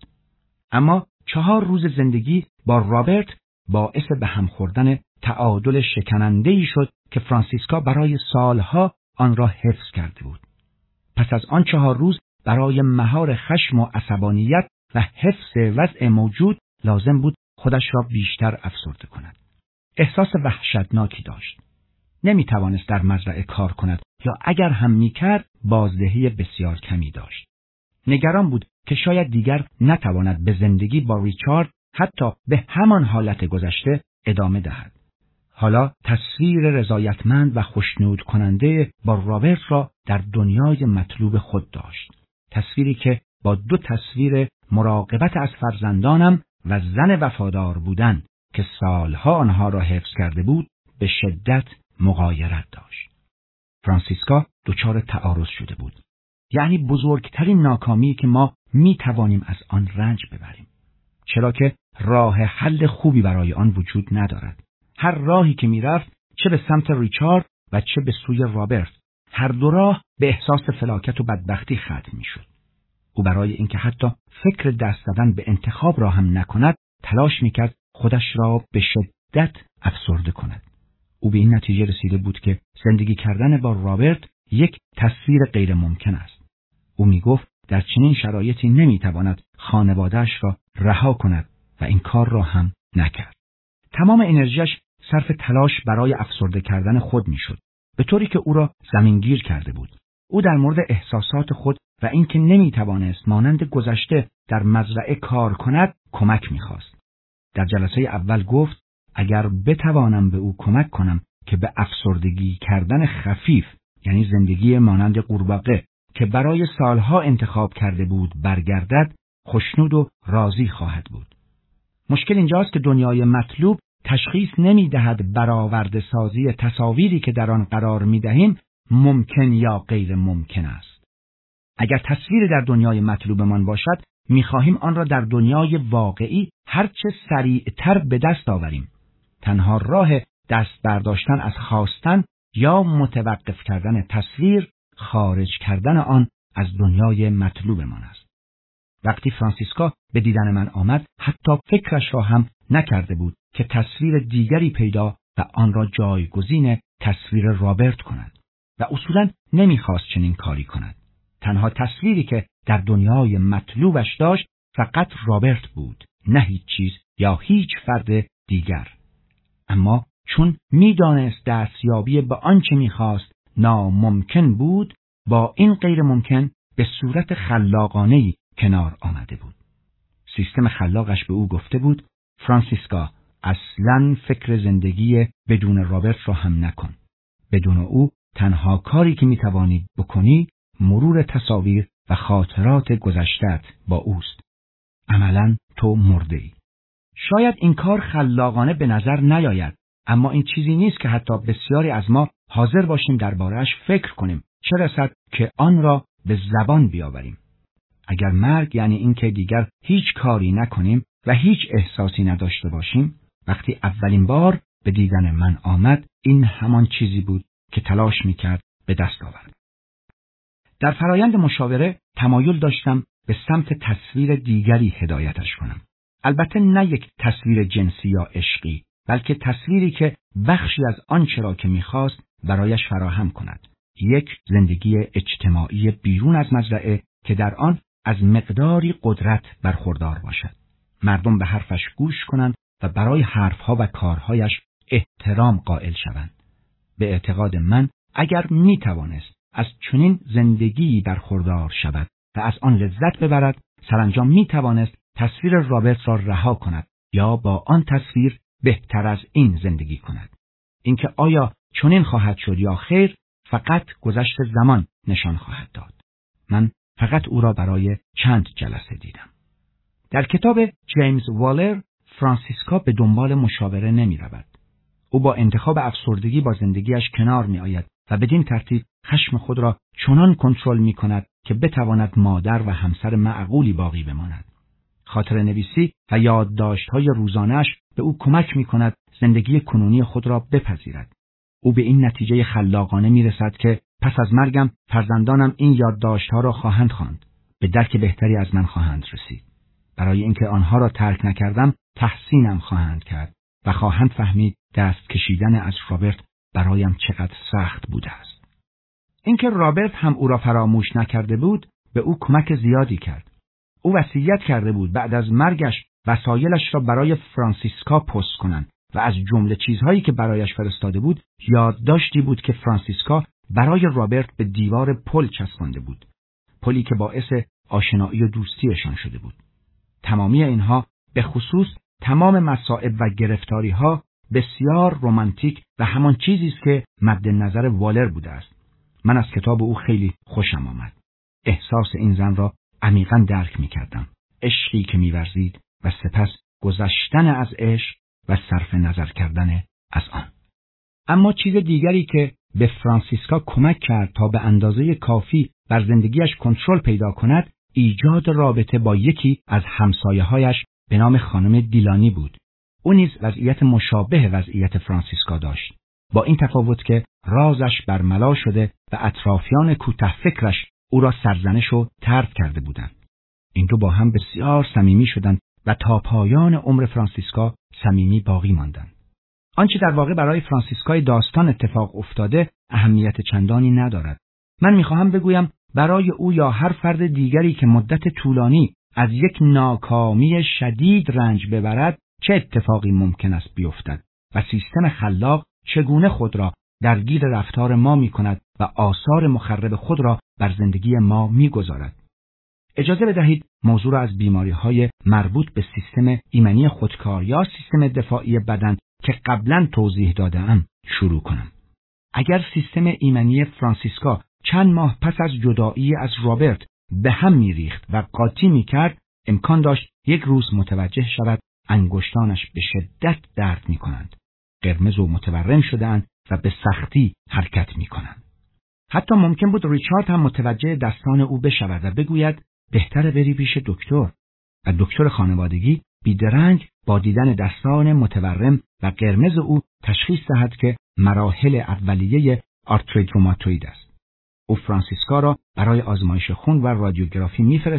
اما چهار روز زندگی با رابرت باعث به هم خوردن تعادل شکننده‌ای شد که فرانسیسکا برای سالها آن را حفظ کرده بود. پس از آن چهار روز برای مهار خشم و عصبانیت و حفظ وضع موجود لازم بود خودش را بیشتر افسرده کند. احساس وحشتناکی داشت. نمی توانست در مزرعه کار کند یا اگر هم می کرد بازدهی بسیار کمی داشت. نگران بود که شاید دیگر نتواند به زندگی با ریچارد حتی به همان حالت گذشته ادامه دهد. حالا تصویر رضایتمند و خوشنود کننده با رابرت را در دنیای مطلوب خود داشت. تصویری که با دو تصویر مراقبت از فرزندانم و زن وفادار بودن که سالها آنها را حفظ کرده بود به شدت مغایرت داشت. فرانسیسکا دچار تعارض شده بود. یعنی بزرگترین ناکامی که ما می توانیم از آن رنج ببریم. چرا که راه حل خوبی برای آن وجود ندارد. هر راهی که می رفت چه به سمت ریچارد و چه به سوی رابرت، هر دو راه به احساس فلاکت و بدبختی ختم می شد. او برای اینکه حتی فکر دست زدن به انتخاب را هم نکند تلاش می کرد خودش را به شدت افسرده کند. او به این نتیجه رسیده بود که زندگی کردن با رابرت یک تصویر غیر ممکن است. او می گفت در چنین شرایطی نمی تواند خانواده‌اش را رها کند و این کار را هم نکرد. تمام انرژیش صرف تلاش برای افسرده کردن خود می شد، به طوری که او را زمینگیر کرده بود. او در مورد احساسات خود و اینکه نمی توانست مانند گذشته در مزرعه کار کند کمک می خواست. در جلسه اول گفت اگر بتوانم به او کمک کنم که به افسردگی کردن خفیف، یعنی زندگی مانند قورباغه که برای سالها انتخاب کرده بود برگردد، خوشنود و راضی خواهد بود. مشکل اینجاست که دنیای مطلوب تشخیص نمی دهد برآورده سازی تصاویری که در آن قرار می دهیم ممکن یا غیر ممکن است. اگر تصویر در دنیای مطلوبمان باشد، می خواهیم آن را در دنیای واقعی هرچه سریعتر به دست آوریم. تنها راه دست برداشتن از خواستن یا متوقف کردن تصویر، خارج کردن آن از دنیای مطلوبمان است. وقتی فرانسیسکا به دیدن من آمد حتی فکرش را هم نکرده بود که تصویر دیگری پیدا و آن را جایگزین تصویر رابرت کند و اصولاً نمیخواست چنین کاری کند. تنها تصویری که در دنیای مطلوبش داشت فقط رابرت بود، نه هیچ چیز یا هیچ فرد دیگر. اما چون میدانست دستیابی به آنچه میخواست ناممکن بود، با این غیر ممکن به صورت خلاقانه‌ای کنار آمده بود. سیستم خلاقش به او گفته بود: فرانسیسکا، اصلاً فکر زندگی بدون رابرت را هم نکن. بدون او تنها کاری که میتوانی بکنی مرور تصاویر و خاطرات گذشته‌ات با اوست. عملاً تو مرده‌ای. شاید این کار خلاقانه به نظر نیاید، اما این چیزی نیست که حتی بسیاری از ما حاضر باشیم درباره‌اش فکر کنیم، چه رسد که آن را به زبان بیاوریم. اگر مرگ یعنی این که دیگر هیچ کاری نکنیم و هیچ احساسی نداشته باشیم، وقتی اولین بار به دیدن من آمد، این همان چیزی بود که تلاش میکرد به دست آورد. در فرایند مشاوره تمایل داشتم به سمت تصویر دیگری هدایتش کنم. البته نه یک تصویر جنسی یا عشقی، بلکه تصویری که بخشی از آنچه را که میخواست برایش فراهم کند. یک زندگی اجتماعی بیرون از مزرعه که در آن از مقداری قدرت برخوردار باشد. مردم به حرفش گوش کنند و برای حرفها و کارهایش احترام قائل شوند. به اعتقاد من اگر می توانست از چنین زندگی برخوردار شود و از آن لذت ببرد، سرانجام می توانست تصویر رابرت را رها کند یا با آن تصویر بهتر از این زندگی کند. اینکه آیا چنین خواهد شد یا خیر، فقط گذشت زمان نشان خواهد داد. من فقط او را برای چند جلسه دیدم. در کتاب جیمز والر، فرانسیسکا به دنبال مشاوره نمی رود. او با انتخاب افسردگی با زندگیش کنار می آید و بدین ترتیب خشم خود را چنان کنترل می کند که بتواند مادر و همسر معقولی باقی بماند. خاطر نویسی و یادداشت‌های روزانه‌اش به او کمک می کند زندگی کنونی خود را بپذیرد. او به این نتیجه خلاقانه می رسد که پس از مرگم فرزندانم این یادداشت‌ها را خواهند خواند، به درک بهتری از من خواهند رسید. برای اینکه آنها را ترک نکردم تحسینم خواهند کرد و خواهند فهمید دست کشیدن از رابرت برایم چقدر سخت بوده است. اینکه رابرت هم او را فراموش نکرده بود به او کمک زیادی کرد. او وصیت کرده بود بعد از مرگش وسایلش را برای فرانسیسکا پست کنند و از جمله چیزهایی که برایش فرستاده بود یادداشتی بود که فرانسیسکا برای رابرت به دیوار پل چسبانده بود، پلی که باعث آشنایی و دوستیشان شده بود. تمامی اینها به خصوص تمام مصائب و گرفتاری‌ها بسیار رمانتیک و همان چیزی است که مد نظر والر بوده است. من از کتاب او خیلی خوشم آمد. احساس این زن را عمیقاً درک می‌کردم. عشقی که می‌ورزید و سپس گذشتن از عشق و صرف نظر کردن از آن. اما چیز دیگری که به فرانسیسکا کمک کرد تا به اندازه کافی بر زندگیش کنترل پیدا کند، ایجاد رابطه با یکی از همسایه‌هایش به نام خانم دیلانی بود. او نیز وضعیت مشابه وضعیت فرانسیسکا داشت، با این تفاوت که رازش برملا شده و اطرافیان کوته فکرش او را سرزنش و طرد کرده بودند. این دو با هم بسیار صمیمی شدند و تا پایان عمر فرانسیسکا صمیمی باقی ماندند. آنچه در واقع برای فرانسیسکای داستان اتفاق افتاده اهمیت چندانی ندارد. من میخواهم بگویم برای او یا هر فرد دیگری که مدت طولانی از یک ناکامی شدید رنج ببرد چه اتفاقی ممکن است بیفتد و سیستم خلاق چگونه خود را درگیر رفتار ما میکند و آثار مخرب خود را بر زندگی ما میگذارد. اجازه بدهید موضوع را از بیماری‌های مربوط به سیستم ایمنی خودکار یا سیستم دفاعی بدن که قبلا توضیح داده‌ام شروع کنم. اگر سیستم ایمنی فرانسیسکا چند ماه پس از جدایی از رابرت به هم می‌ریخت و قاطی می‌کرد، امکان داشت یک روز متوجه شود انگشتانش به شدت درد می‌کنند، قرمز و متورم شده‌اند و به سختی حرکت می‌کنند. حتی ممکن بود ریچارد هم متوجه دستان او بشود و بگوید بهتره بری پیش دکتر، و دکتر خانوادگی بیدرنگ با دیدن دستان متورم و قرمز او تشخیص دهد که مراحل اولیه آرتریت روماتوئید است. او فرانسیسکا را برای آزمایش خون و رادیوگرافی میفرستد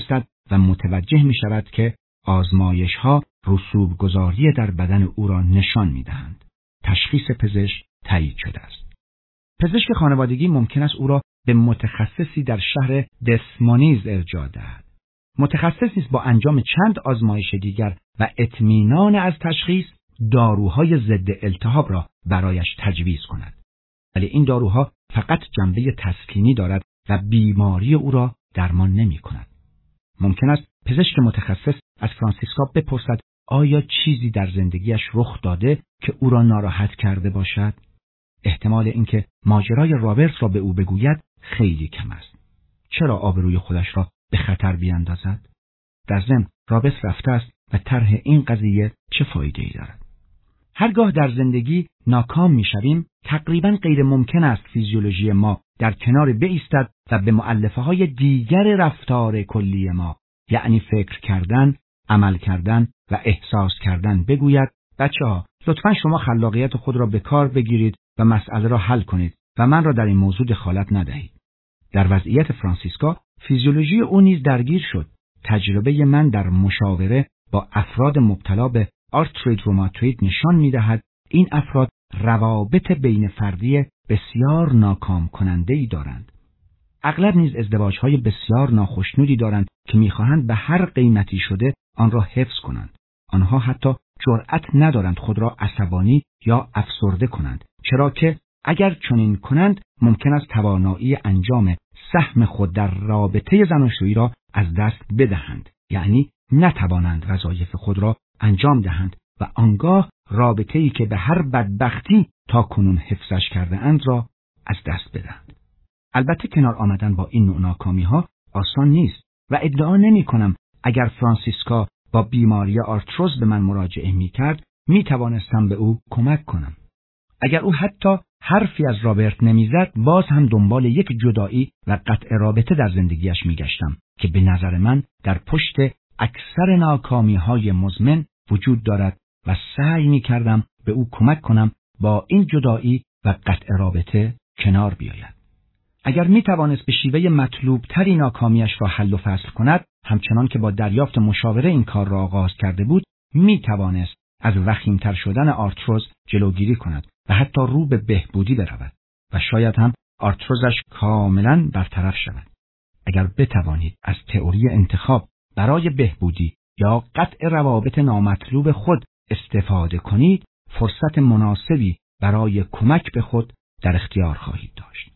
و متوجه می شود که آزمایش ها رسوب گذاری در بدن او را نشان می دهند. تشخیص پزشک تایید شده است. پزشک خانوادگی ممکن است او را به متخصصی در شهر دسمونیز ارجاع دهد. متخصصی است با انجام چند آزمایش دیگر و اطمینان از تشخیص داروهای ضد التهاب را برایش تجویز کند. ولی این داروها فقط جنبه تسکینی دارد و بیماری او را درمان نمی کند. ممکن است پزشک متخصص از فرانسیسکا بپرسد آیا چیزی در زندگیش رخ داده که او را ناراحت کرده باشد؟ احتمال اینکه ماجرای رابرت را به او بگوید خیلی کم است. چرا آبروی خودش را به خطر بیاندازد؟ در ضمن رابرت رفته است و طرح این قضیه چه فایده‌ای دارد؟ هرگاه در زندگی ناکام می‌شویم، تقریباً غیر ممکن است فیزیولوژی ما در کنار بایستد و به مؤلفه‌های دیگر رفتار کلی ما، یعنی فکر کردن، عمل کردن و احساس کردن بگوید بچه‌ها لطفاً شما خلاقیت خود را به کار بگیرید و مسئله را حل کنید و من را در این موضوع دخالت ندهید. در وضعیت فرانسیسکا فیزیولوژی او نیز درگیر شد. تجربه من در مشاوره با افراد مبتلا به آرتریت روماتوئید نشان می‌دهد این افراد روابط بین فردی بسیار ناکام کننده‌ای دارند. اغلب نیز ازدواج‌های بسیار ناخشنودی دارند که می‌خواهند به هر قیمتی شده آن را حفظ کنند. آنها حتی جرأت ندارند خود را عصبانی یا افسرده کنند، چرا که اگر چنین کنند ممکن است توانایی انجام سهم خود در رابطه زناشویی را از دست بدهند، یعنی نتوانند وظایف خود را انجام دهند و آنگاه رابطه‌ای که به هر بدبختی تا کنون حفظش کرده اند را از دست بدهند. البته کنار آمدن با این نوع ناکامی‌ها آسان نیست و ادعا نمی‌کنم اگر فرانسیسکا با بیماری آرتروز به من مراجعه می‌کرد می‌توانستم به او کمک کنم. اگر او حتی حرفی از رابرت نمیزد باز هم دنبال یک جدایی و قطع رابطه در زندگیش میگشتم که به نظر من در پشت اکثر ناکامی‌های مزمن وجود دارد و سعی می‌کردم به او کمک کنم با این جدایی و قطع رابطه کنار بیاید. اگر می‌توانست به شیوه مطلوب تری ناکامیش را حل و فصل کند، همچنان که با دریافت مشاوره این کار را آغاز کرده بود، می‌توانست از وخیم‌تر شدن آرتروز جلوگیری کند و حتی رو به بهبودی برود و شاید هم آرتروزش کاملاً برطرف شود. اگر بتوانید از تئوری انتخاب برای بهبودی یا قطع روابط نامطلوب خود استفاده کنید، فرصت مناسبی برای کمک به خود در اختیار خواهید داشت.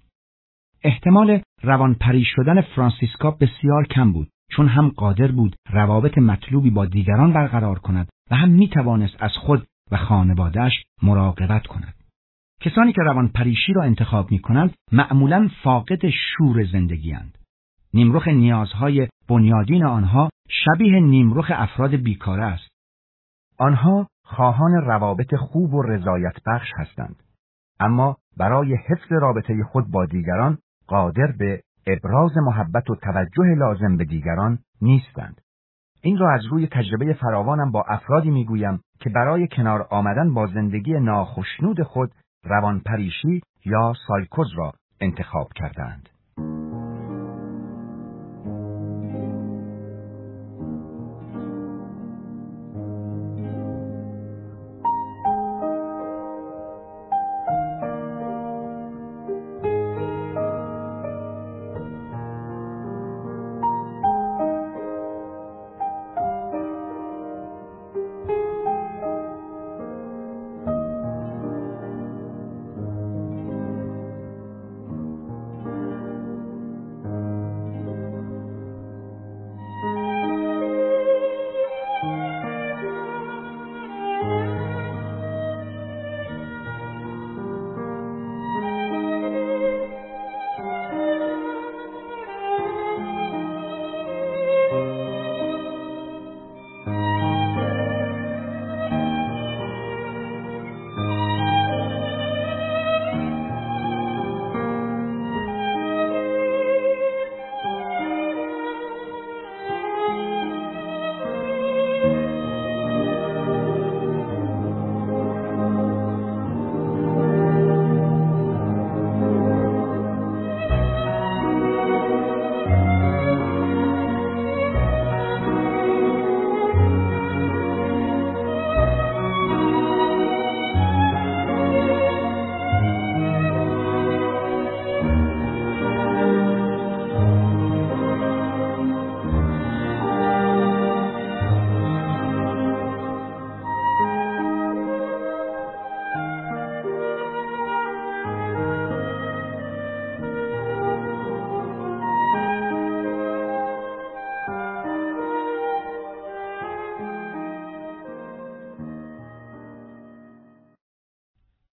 احتمال روانپری شدن فرانسیسکا بسیار کم بود، چون هم قادر بود روابط مطلوبی با دیگران برقرار کند و هم می توانست از خود و خانواده‌اش مراقبت کند. کسانی که روانپریشی را انتخاب می کنند معمولاً فاقد شور زندگی اند. نیمرخ نیازهای بنیادین آنها شبیه نیمرخ افراد بیکاره است. آنها خواهان روابط خوب و رضایت بخش هستند، اما برای حفظ رابطه خود با دیگران قادر به ابراز محبت و توجه لازم به دیگران نیستند. این را از روی تجربه فراوانم با افرادی میگویم که برای کنار آمدن با زندگی ناخشنود خود روانپریشی یا سایکوز را انتخاب کردند.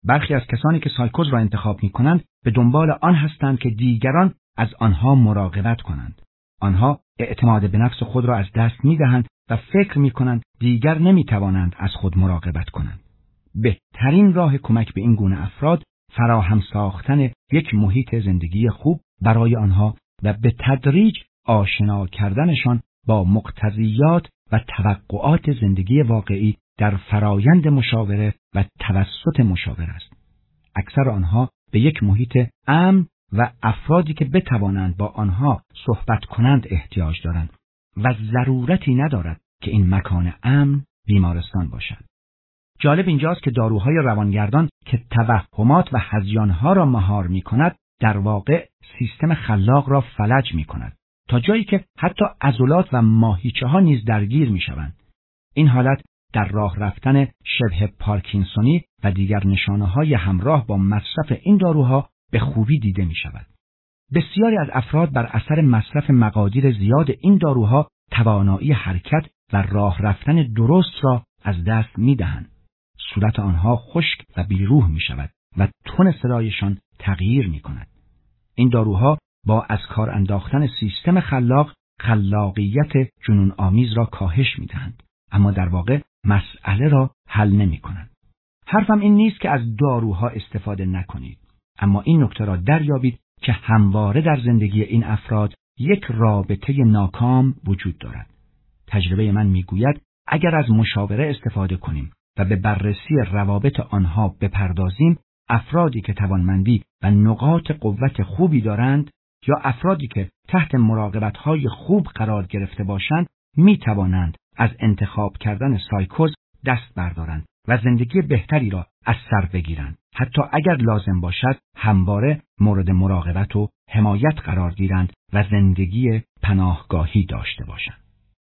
برخی از کسانی که سایکوز را انتخاب می‌کنند به دنبال آن هستند که دیگران از آنها مراقبت کنند. آنها اعتماد به نفس خود را از دست می‌دهند و فکر می‌کنند دیگر نمی‌توانند از خود مراقبت کنند. بهترین راه کمک به این گونه افراد فراهم ساختن یک محیط زندگی خوب برای آنها و به تدریج آشنا کردنشان با مقتضیات و توقعات زندگی واقعی در فرایند مشاوره و توسط مشاور است. اکثر آنها به یک محیط امن و افرادی که بتوانند با آنها صحبت کنند احتیاج دارند و ضرورتی ندارد که این مکان امن بیمارستان باشد. جالب اینجاست که داروهای روانگردان که توهمات و هذیانها را مهار می کند در واقع سیستم خلاق را فلج می کند تا جایی که حتی عضلات و ماهیچه ها نیز درگیر می شوند. این حالت در راه رفتن شبه پارکینسونی و دیگر نشانه های همراه با مصرف این داروها به خوبی دیده می شود. بسیاری از افراد بر اثر مصرف مقادیر زیاد این داروها توانایی حرکت و راه رفتن درست را از دست می دهند. صورت آنها خشک و بیروح می شود و تون صدایشان تغییر می کند. این داروها با از کار انداختن سیستم خلاق خلاقیت جنون آمیز را کاهش می دهند، اما در واقع مسئله را حل نمی کنند. حرفم این نیست که از داروها استفاده نکنید، اما این نکته را دریابید که همواره در زندگی این افراد یک رابطه ناکام وجود دارد. تجربه من می گوید اگر از مشاوره استفاده کنیم و به بررسی روابط آنها بپردازیم، افرادی که توانمندی و نقاط قوت خوبی دارند یا افرادی که تحت مراقبت‌های خوب قرار گرفته باشند می توانند از انتخاب کردن سایکوز دست بردارند و زندگی بهتری را از سر بگیرند، حتی اگر لازم باشد همواره مورد مراقبت و حمایت قرار گیرند و زندگی پناهگاهی داشته باشند.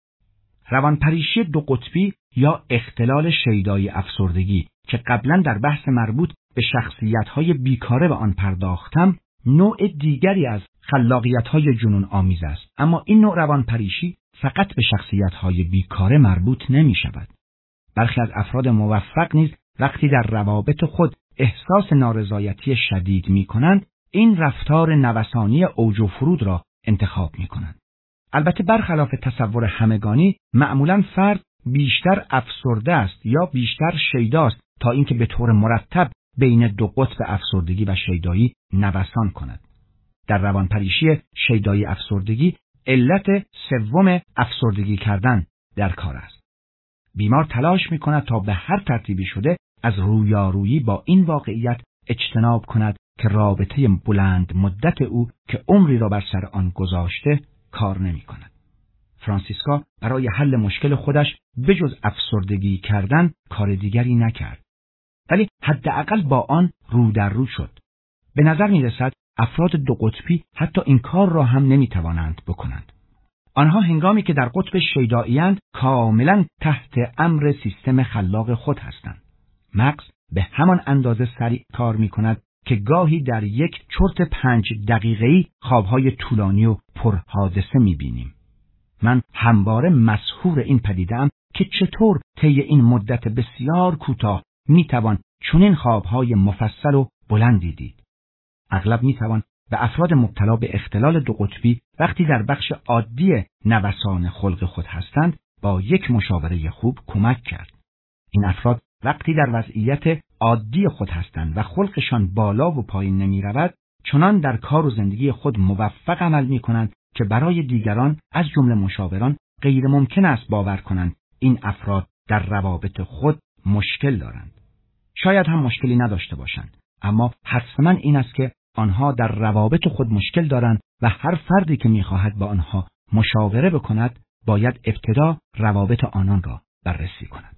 روانپریشی دو قطبی یا اختلال شیدایی افسردگی که قبلا در بحث مربوط به شخصیت‌های بیکاره به آن پرداختم، نوع دیگری از خلاقیت‌های جنون آمیز است، اما این نوع روانپریشی فقط به شخصیت‌های بیکاره مربوط نمی‌شود. برخی از افراد موفق نیز وقتی در روابط خود احساس نارضایتی شدید می‌کنند، این رفتار نوسانی اوج و فرود را انتخاب می‌کنند. البته برخلاف تصور همگانی، معمولاً فرد بیشتر افسرده است یا بیشتر شیداست تا اینکه به طور مرتب بین دو قطب افسردگی و شیدایی نوسان کند. در روانپریشی شیدایی افسردگی علت سوم افسردگی کردن در کار است. بیمار تلاش می‌کند تا به هر ترتیبی شده از رویارویی با این واقعیت اجتناب کند که رابطه بلند مدت او که عمری را بر سر آن گذاشته کار نمی‌کند. فرانسیسکا برای حل مشکل خودش بجز افسردگی کردن کار دیگری نکرد، ولی حداقل با آن رو در رو شد. به نظر می‌رسد افراد دو قطبی حتی این کار را هم نمی‌توانند بکنند. آنها هنگامی که در قطب شیدایی‌اند کاملاً تحت امر سیستم خلاق خود هستند. مغز به همان اندازه سریع کار می‌کند که گاهی در یک چرت پنج دقیقه‌ای خواب‌های طولانی و پرحادثه می‌بینیم. من همواره مسحور این پدیده‌ام که چطور طی این مدت بسیار کوتاه می‌توان چنین خواب‌های مفصل و بلندی دید. اغلب می‌توان به افراد مبتلا به اختلال دو قطبی وقتی در بخش عادی نوسان خلق خود هستند با یک مشاوره خوب کمک کرد. این افراد وقتی در وضعیت عادی خود هستند و خلقشان بالا و پایین نمی‌رود، چنان در کار و زندگی خود موفق عمل می‌کنند که برای دیگران از جمله مشاوران غیر ممکن است باور کنند این افراد در روابط خود مشکل دارند. شاید هم مشکلی نداشته باشند، اما حتما این است که آنها در روابط خود مشکل دارند و هر فردی که می‌خواهد با آنها مشاوره بکند باید ابتدا روابط آنان را بررسی کند.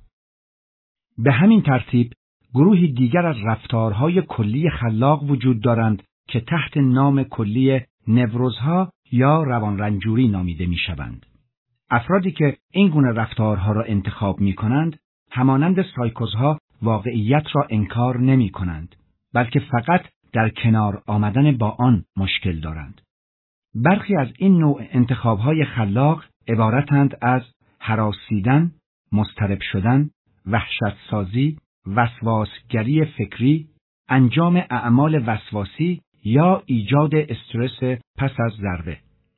به همین ترتیب گروهی دیگر از رفتارهای کلی خلاق وجود دارند که تحت نام کلی نوروزها یا روان رنجوری نامیده می‌شوند. افرادی که این گونه رفتارها را انتخاب می‌کنند همانند سایکوزها واقعیت را انکار نمی‌کنند، بلکه فقط در کنار آمدن با آن مشکل دارند. برخی از این نوع انتخاب‌های خلاق عبارتند از هراسیدن، مضطرب شدن، وحشت سازی، وسواسگری فکری، انجام اعمال وسواسی یا ایجاد استرس پس از ضربه.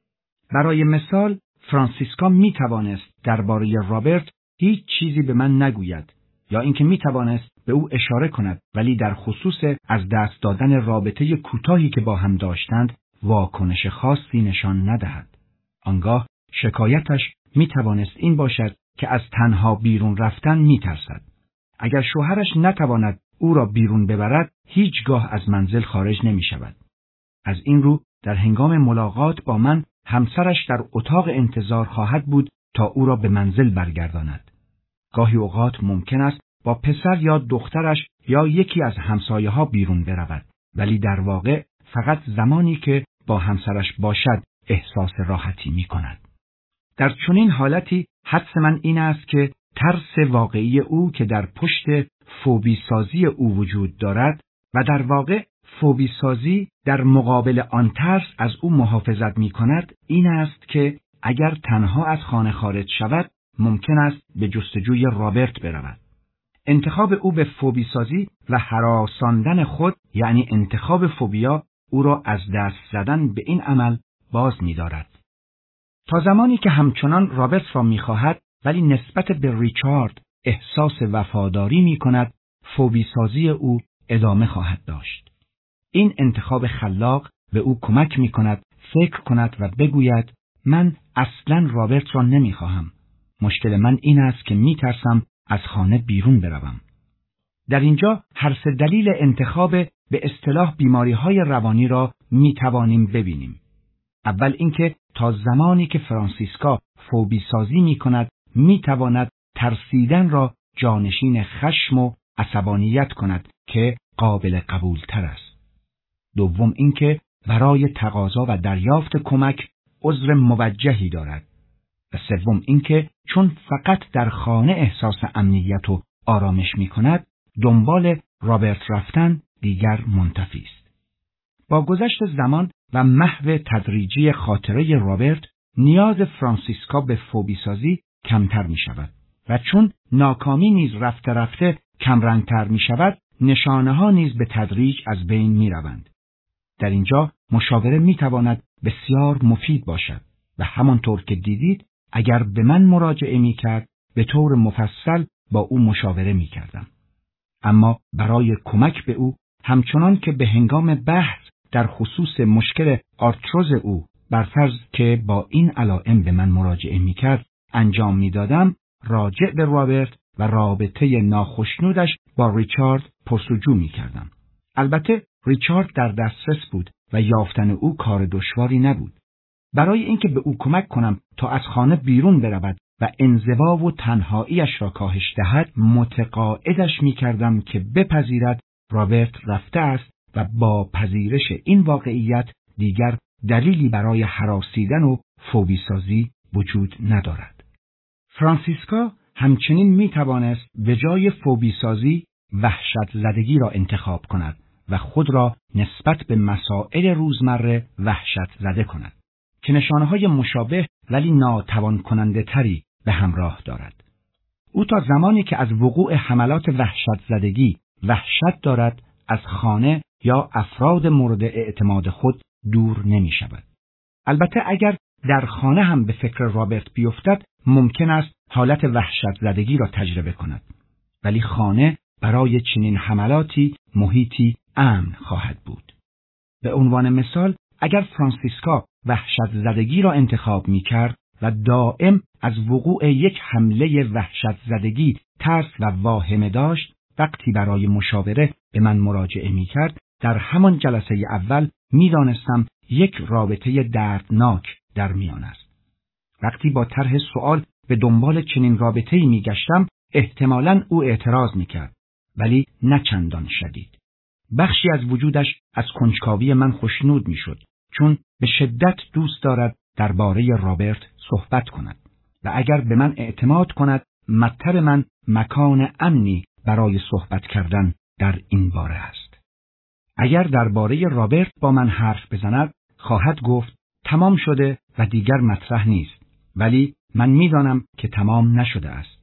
برای مثال، فرانسیسکا می توانست درباره رابرت هیچ چیزی به من نگوید یا اینکه می توانست به او اشاره کند ولی در خصوص از دست دادن رابطه کوتاهی که با هم داشتند واکنش خاصی نشان ندهد. آنگاه شکایتش می توانست این باشد که از تنها بیرون رفتن می ترسد. اگر شوهرش نتواند او را بیرون ببرد، هیچگاه از منزل خارج نمی شود. از این رو در هنگام ملاقات با من همسرش در اتاق انتظار خواهد بود تا او را به منزل برگرداند. گاهی اوقات ممکن است با پسر یا دخترش یا یکی از همسایه ها بیرون برود، ولی در واقع فقط زمانی که با همسرش باشد احساس راحتی می کند. در چنین حالتی حدس من این است که ترس واقعی او که در پشت فوبی سازی او وجود دارد و در واقع فوبی سازی در مقابل آن ترس از او محافظت می کند این است که اگر تنها از خانه خارج شود ممکن است به جستجوی رابرت برود. انتخاب او به فوبی سازی و هراساندن خود یعنی انتخاب فوبیا او را از دست زدن به این عمل باز می دارد. تا زمانی که همچنان رابرت را می خواهد ولی نسبت به ریچارد احساس وفاداری می کند، فوبی سازی او ادامه خواهد داشت. این انتخاب خلاق به او کمک می کند فکر کند و بگوید من اصلاً رابرت را نمی خواهم. مشکل من این است که می ترسم از خانه بیرون بروم. در اینجا هر سه دلیل انتخاب به اصطلاح بیماری‌های روانی را می توانیم ببینیم. اول اینکه تا زمانی که فرانسیسکا فوبی سازی می کند می تواند ترسیدن را جانشین خشم و عصبانیت کند که قابل قبول تر است. دوم اینکه برای تقاضا و دریافت کمک عذر موجهی دارد. و سوم اینکه چون فقط در خانه احساس امنیت و آرامش می کند دنبال رابرت رفتن دیگر منتفی است. با گذشت زمان و محو تدریجی خاطره رابرت نیاز فرانسیسکا به فوبی سازی کمتر می شود و چون ناکامی نیز رفته رفته کمرنگتر می شود نشانه ها نیز به تدریج از بین می روند. در اینجا مشاوره می تواند بسیار مفید باشد و همانطور که دیدید اگر به من مراجعه می کرد به طور مفصل با او مشاوره می کردم. اما برای کمک به او همچنان که به هنگام بحث در خصوص مشکل آرتروز او برفرض که با این علائم به من مراجعه می کرد انجام می دادم راجع به رابرت و رابطه ناخشنودش با ریچارد پرسجو می کردم. البته ریچارد در دسترس بود و یافتن او کار دشواری نبود. برای اینکه به او کمک کنم تا از خانه بیرون برود و انزوا و تنهاییش را کاهش دهد متقاعدش می کردم که بپذیرد رابرت رفته است و با پذیرش این واقعیت دیگر دلیلی برای هراسیدن و فوبی سازی وجود ندارد. فرانسیسکا همچنین می توانست به جای فوبی سازی وحشت زدگی را انتخاب کند و خود را نسبت به مسائل روزمره وحشت زده کند که نشانه‌های مشابه ولی ناتوان کننده تری به همراه دارد. او تا زمانی که از وقوع حملات وحشت زدگی وحشت دارد از خانه یا افراد مورد اعتماد خود دور نمی شود. البته اگر در خانه هم به فکر رابرت بیفتد ممکن است حالت وحشت زدگی را تجربه کند. ولی خانه برای چنین حملاتی محیطی امن خواهد بود. به عنوان مثال اگر فرانسیسکا وحشت زدگی را انتخاب می کرد و دائم از وقوع یک حمله وحشت زدگی ترس و واهمه داشت وقتی برای مشاوره به من مراجعه می کرد در همان جلسه اول می دانستم یک رابطه دردناک در میان است. وقتی با طرح سوال به دنبال چنین رابطه‌ای می گشتم احتمالاً او اعتراض می کرد ولی نه چندان شدید. بخشی از وجودش از کنجکاوی من خوشنود می شد چون به شدت دوست دارد درباره رابرت صحبت کند و اگر به من اعتماد کند مطلب من مکان امنی برای صحبت کردن در این باره است. اگر درباره رابرت با من حرف بزند خواهد گفت تمام شده و دیگر مطرح نیست، ولی من میدانم که تمام نشده است.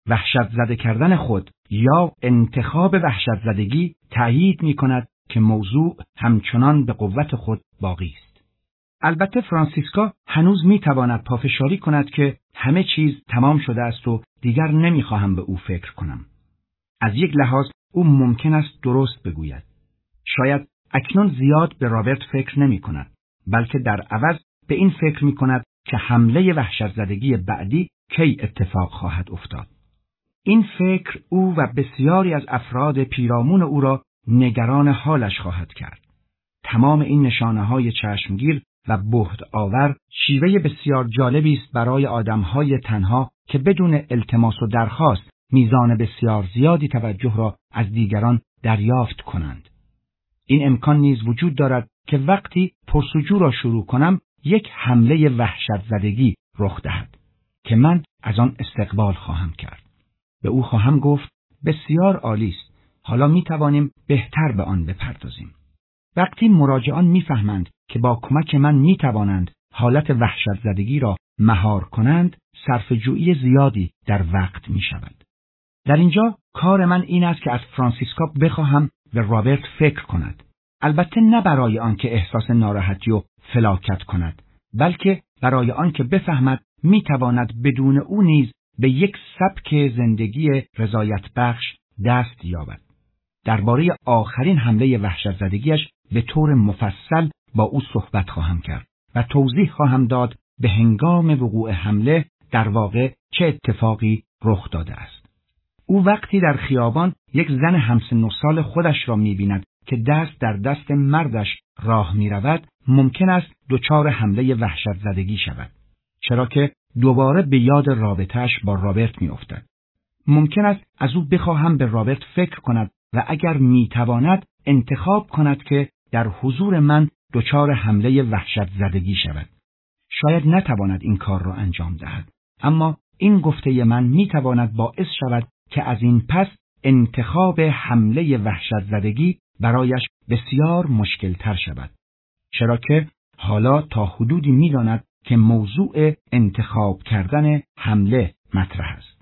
وحشت زده کردن خود یا انتخاب وحشت زدگی تأیید می کند که موضوع همچنان به قوت خود باقی است. البته فرانسیسکا هنوز می تواند پافشاری کند که همه چیز تمام شده است و دیگر نمی خواهم به او فکر کنم. از یک لحاظ او ممکن است درست بگوید. شاید اکنون زیاد به رابرت فکر نمی کند، بلکه در عوض به این فکر می کند که حمله وحشت زدگی بعدی کی اتفاق خواهد افتاد. این فکر او و بسیاری از افراد پیرامون او را نگران حالش خواهد کرد. تمام این نشانه‌های چشمگیر و بهت آور شیوه بسیار جالبی است برای آدم‌های تنها که بدون التماس و درخواست میزان بسیار زیادی توجه را از دیگران دریافت کنند. این امکان نیز وجود دارد که وقتی پرسجو را شروع کنم یک حمله وحشت زدگی رخ دهد که من از آن استقبال خواهم کرد. به او خواهم گفت بسیار عالی است. حالا می توانیم بهتر به آن بپردازیم. وقتی مراجعان میفهمند که با کمک من می توانند حالت وحشت زدگی را مهار کنند، صرفه‌جویی زیادی در وقت می شود. در اینجا کار من این است که از فرانسیسکا بخواهم به رابرت فکر کند. البته نه برای آنکه احساس ناراحتی و فلاکت کند، بلکه برای آنکه بفهمد می تواند بدون او نیز به یک سبک زندگی رضایت بخش دست یابد. درباره آخرین حمله وحشت زدگیش به طور مفصل با او صحبت خواهم کرد و توضیح خواهم داد به هنگام وقوع حمله در واقع چه اتفاقی رخ داده است. او وقتی در خیابان یک زن همسن و سال خودش را می‌بیند که دست در دست مردش راه می‌رود، ممکن است دچار حمله وحشت زدگی شود، چرا که دوباره به یاد رابطه‌اش با رابرت می‌افتد. ممکن است از او بخواهم به رابرت فکر کند و اگر می‌تواند انتخاب کند که در حضور من دچار حمله وحشت زدگی شود. شاید نتواند این کار را انجام دهد، اما این گفته من می‌تواند باعث شود که از این پس انتخاب حمله وحشت زدگی برایش بسیار مشکل تر شود، چرا که حالا تا حدودی می‌داند که موضوع انتخاب کردن حمله مطرح است.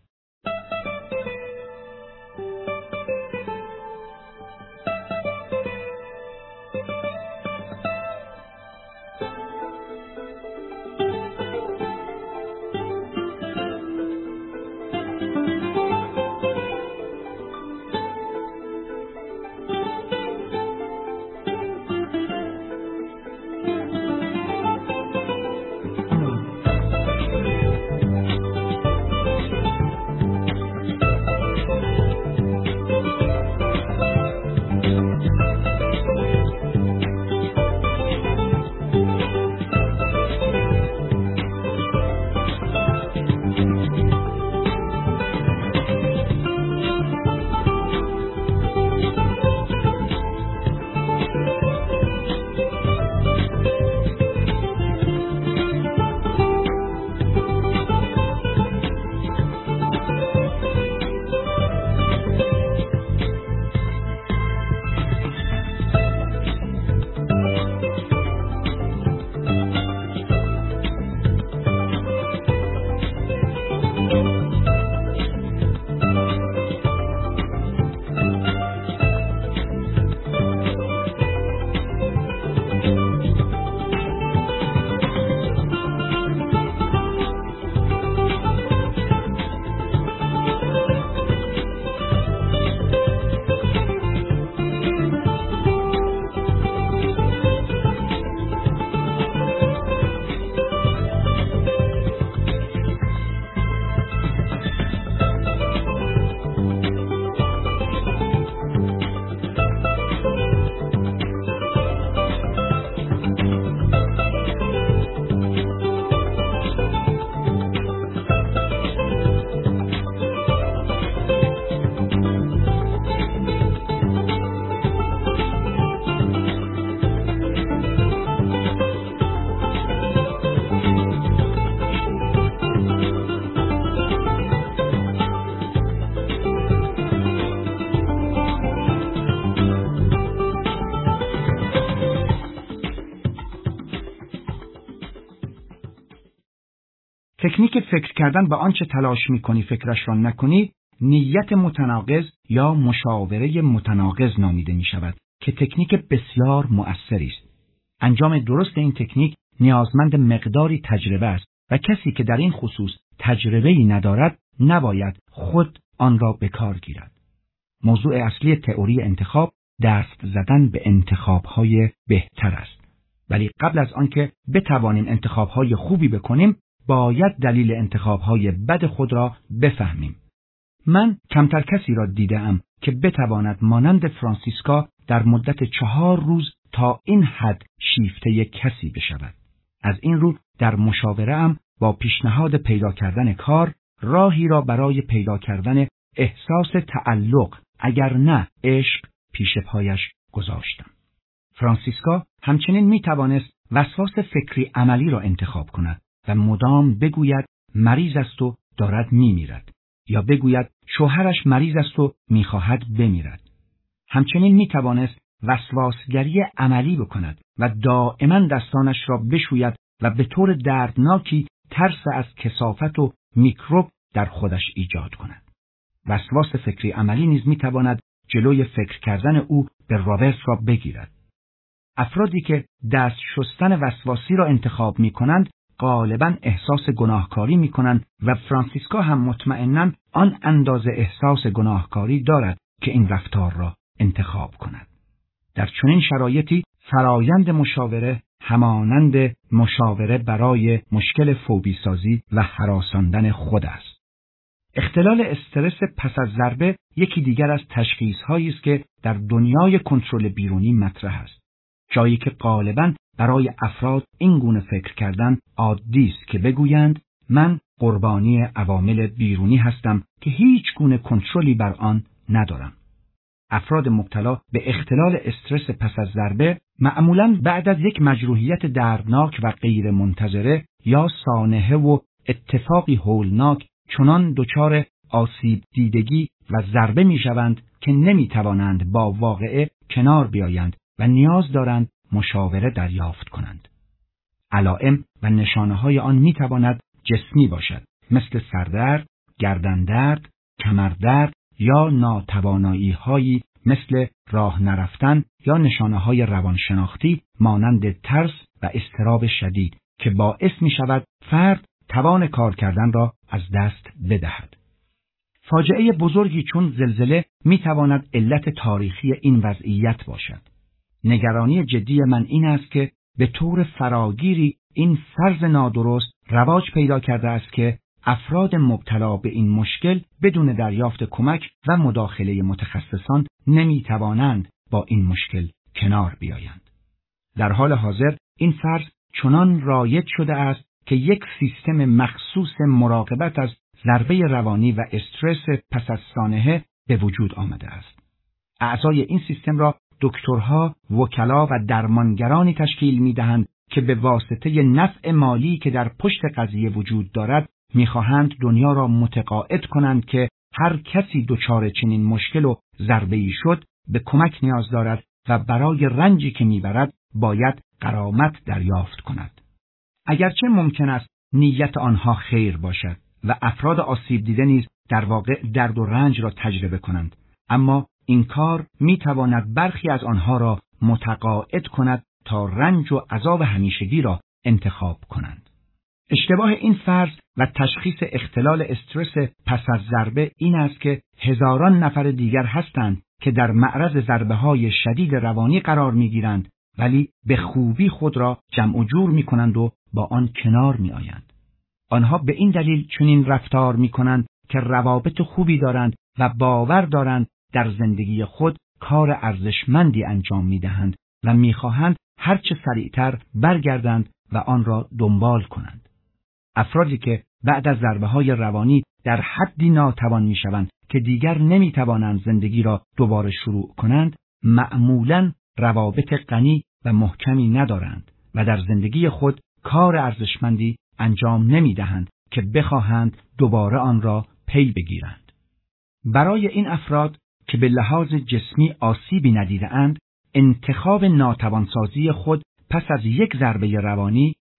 تکنیک فکر کردن به آنچه تلاش می‌کنی فکرش را نکنی، نیت متناقض یا مشاوره متناقض نامیده می‌شود که تکنیک بسیار مؤثری است. انجام درست این تکنیک نیازمند مقداری تجربه است و کسی که در این خصوص تجربه‌ای ندارد نباید خود آن را به کار گیرد. موضوع اصلی تئوری انتخاب دست زدن به انتخاب‌های بهتر است. ولی قبل از آنکه بتوانیم انتخاب‌های خوبی بکنیم، باید دلیل انتخاب‌های بد خود را بفهمیم. من کمتر کسی را دیدم که بتواند مانند فرانسیسکا در مدت چهار روز تا این حد شیفته کسی بشود. از این رو در مشاوره‌ام با پیشنهاد پیدا کردن کار، راهی را برای پیدا کردن احساس تعلق اگر نه عشق پیش پایش گذاشتم. فرانسیسکا همچنین می توانست وسواس فکری عملی را انتخاب کند و مدام بگوید مریض است و دارد می میرد، یا بگوید شوهرش مریض است و می خواهد بمیرد. همچنین می توانست وسواسگری عملی بکند و دائما دستانش را بشوید و به طور دردناکی ترس از کثافت و میکروب در خودش ایجاد کند. وسواس فکری عملی نیز می تواند جلوی فکر کردن او به راورس را بگیرد. افرادی که دست شستن وسواسی را انتخاب می کنند غالباً احساس گناهکاری می کنند و فرانسیسکا هم مطمئناً آن اندازه احساس گناهکاری دارد که این رفتار را انتخاب کند. در چنین شرایطی فرایند مشاوره همانند مشاوره برای مشکل فوبی سازی و هراساندن خود است. اختلال استرس پس از ضربه یکی دیگر از تشخیص‌هایی است که در دنیای کنترل بیرونی مطرح است. جایی که غالباً برای افراد این گونه فکر کردن عادی است که بگویند من قربانی عوامل بیرونی هستم که هیچ گونه کنترلی بر آن ندارم. افراد مبتلا به اختلال استرس پس از ضربه معمولاً بعد از یک مجروحیت دردناک و غیر منتظره یا سانحه و اتفاقی هولناک چنان دچار آسیب دیدگی و ضربه می شوند که نمی توانند با واقعه کنار بیایند و نیاز دارند مشاوره دریافت کنند. علائم و نشانه های آن می تواند جسمی باشد، مثل سردرد، گردندرد، کمردرد یا ناتوانایی هایی مثل راه نرفتن یا نشانه های روانشناختی مانند ترس و اضطراب شدید که باعث می شود فرد توان کار کردن را از دست بدهد. فاجعه بزرگی چون زلزله می تواند علت تاریخی این وضعیت باشد. نگرانی جدی من این است که به طور فراگیری این فرض نادرست رواج پیدا کرده است که افراد مبتلا به این مشکل بدون دریافت کمک و مداخله متخصصان نمی توانند با این مشکل کنار بیایند. در حال حاضر این فرض چنان رایج شده است که یک سیستم مخصوص مراقبت از ضربه روانی و استرس پس از سانحه به وجود آمده است. اعضای این سیستم را دکترها، وکلا و درمانگرانی تشکیل می‌دهند که به واسطه نفع مالی که در پشت قضیه وجود دارد می‌خواهند دنیا را متقاعد کنند که هر کسی دچار چنین مشکل و ضربه‌ای شد به کمک نیاز دارد و برای رنجی که می‌برد باید غرامت دریافت کند. اگرچه ممکن است نیت آنها خیر باشد و افراد آسیب دیده نیز در واقع درد و رنج را تجربه کنند، اما این کار می تواند برخی از آنها را متقاعد کند تا رنج و عذاب همیشگی را انتخاب کنند. اشتباه این فرض و تشخیص اختلال استرس پس از ضربه این است که هزاران نفر دیگر هستند که در معرض ضربه‌های شدید روانی قرار می‌گیرند ولی به خوبی خود را جمع و جور می‌کنند و با آن کنار می‌آیند. آنها به این دلیل چنین رفتار می‌کنند که روابط خوبی دارند و باور دارند در زندگی خود کار ارزشمندی انجام می‌دهند و می‌خواهند هرچه سریعتر برگردند و آن را دنبال کنند. افرادی که بعد از ضربه‌های روانی در حدی ناتوان می‌شوند که دیگر نمی‌توانند زندگی را دوباره شروع کنند، معمولاً روابط غنی و محکمی ندارند و در زندگی خود کار ارزشمندی انجام نمی‌دهند که بخواهند دوباره آن را پی بگیرند. برای این افراد که به لحاظ جسمی آسیبی ندیده‌اند، انتخاب ناتوانسازی خود پس از یک ضربه روانی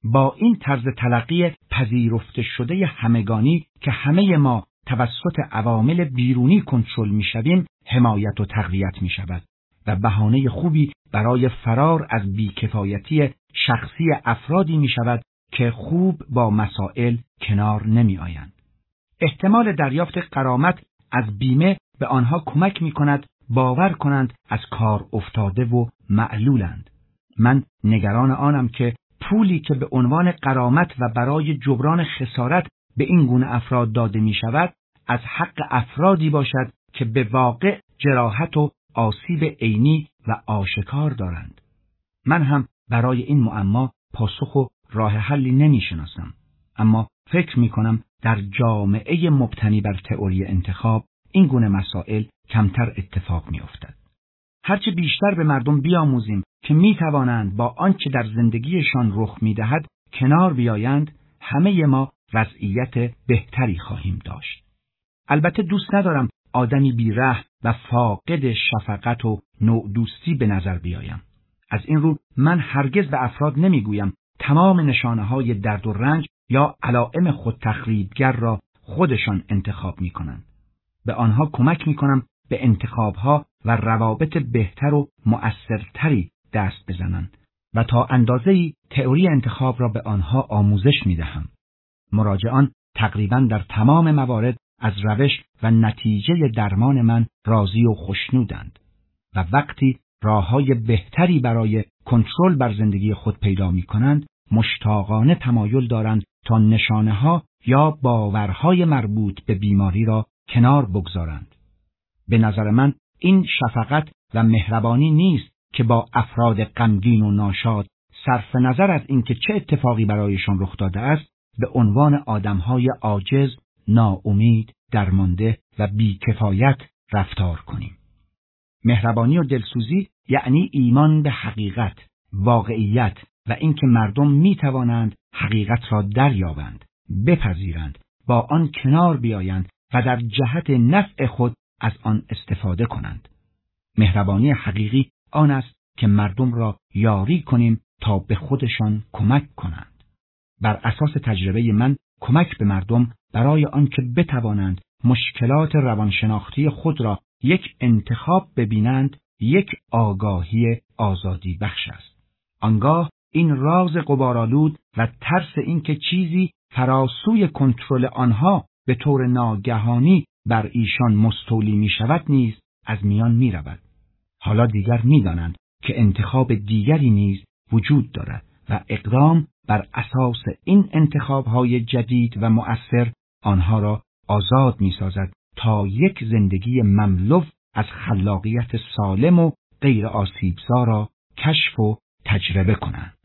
با این طرز تلقی پذیرفته شده همگانی که همه ما توسط عوامل بیرونی کنترل می‌شویم، حمایت و تقویت می‌شود و بهانه خوبی برای فرار از بیکفایتی شخصی افرادی می‌شود که خوب با مسائل کنار نمی‌آیند. احتمال دریافت غرامت از بیمه به آنها کمک می‌کند باور کنند از کار افتاده و معلولند. من نگران آنم که پولی که به عنوان غرامت و برای جبران خسارت به این گونه افراد داده می‌شود از حق افرادی باشد که به واقع جراحت و آسیب عینی و آشکار دارند. من هم برای این معما پاسخ و راه حلی نمی‌شناسم، اما فکر می‌کنم در جامعه مبتنی بر تئوری انتخاب این گونه مسائل کمتر اتفاق می‌افتد. هرچه بیشتر به مردم بیاموزیم که می‌توانند با آنچه در زندگیشان رخ می‌دهد کنار بیایند، همه ما وضعیت بهتری خواهیم داشت. البته دوست ندارم آدمی بی‌رحم و فاقد شفقت و نوع دوستی به نظر بیایم. از این رو من هرگز به افراد نمیگویم تمام نشانه‌های درد و رنج یا علائم خودتخریبگر را خودشان انتخاب می‌کنند. به آنها کمک می‌کنم به انتخاب‌ها و روابط بهتر و مؤثرتری دست بزنند و تا اندازه‌ای تئوری انتخاب را به آنها آموزش می‌دهم. مراجعان تقریباً در تمام موارد از روش و نتیجه درمان من راضی و خوشنودند و وقتی راه‌های بهتری برای کنترل بر زندگی خود پیدا می‌کنند، مشتاقانه تمایل دارند تا نشانه‌ها یا باورهای مربوط به بیماری را کنار بگذارند. به نظر من این شفقت و مهربانی نیست که با افراد غمگین و ناشاد صرف نظر از اینکه چه اتفاقی برایشان رخ داده است به عنوان آدم‌های عاجز، ناامید، درمانده و بی‌کفایت رفتار کنیم. مهربانی و دلسوزی یعنی ایمان به حقیقت، واقعیت و اینکه مردم می‌توانند حقیقت را دریابند، بپذیرند، با آن کنار بیایند و در جهت نفع خود از آن استفاده کنند. مهربانی حقیقی آن است که مردم را یاری کنیم تا به خودشان کمک کنند. بر اساس تجربه من کمک به مردم برای آنکه بتوانند مشکلات روانشناختی خود را یک انتخاب ببینند، یک آگاهی آزادی بخش است. آنگاه این راز غبارآلود و ترس اینکه چیزی فراسوی کنترل آنها به طور ناگهانی بر ایشان مستولی می شود نیز از میان می رود. حالا دیگر می دانند که انتخاب دیگری نیز وجود دارد و اقدام بر اساس این انتخاب‌های جدید و مؤثر آنها را آزاد می سازد تا یک زندگی مملو از خلاقیت سالم و غیر آسیبزا را کشف و تجربه کنند.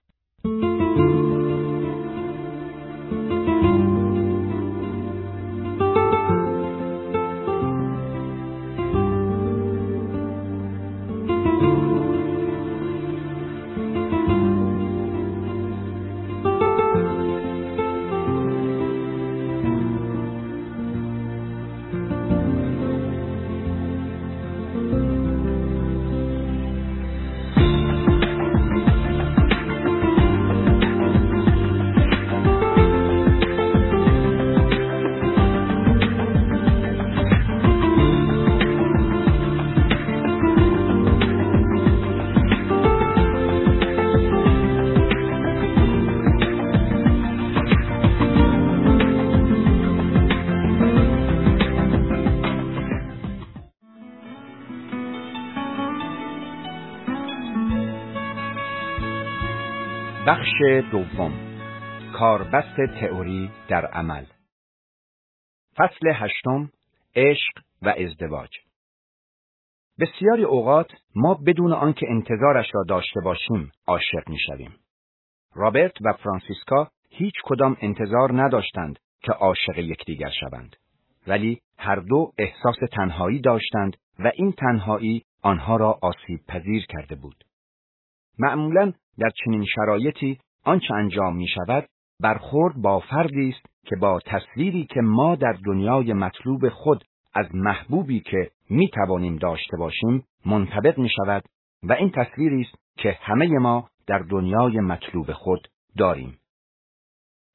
بخش دوم، کاربست تئوری در عمل. فصل هشتم، عشق و ازدواج. بسیاری اوقات ما بدون آنکه انتظارش را داشته باشیم عاشق می‌شویم. رابرت و فرانسیسکا هیچ کدام انتظار نداشتند که عاشق یکدیگر شوند، ولی هر دو احساس تنهایی داشتند و این تنهایی آنها را آسیب پذیر کرده بود. معمولاً در چنین شرایطی آنچه انجام می شود برخورد با فردی است که با تصویری که ما در دنیای مطلوب خود از محبوبی که می توانیم داشته باشیم منطبق می شود و این تصویری است که همه ما در دنیای مطلوب خود داریم.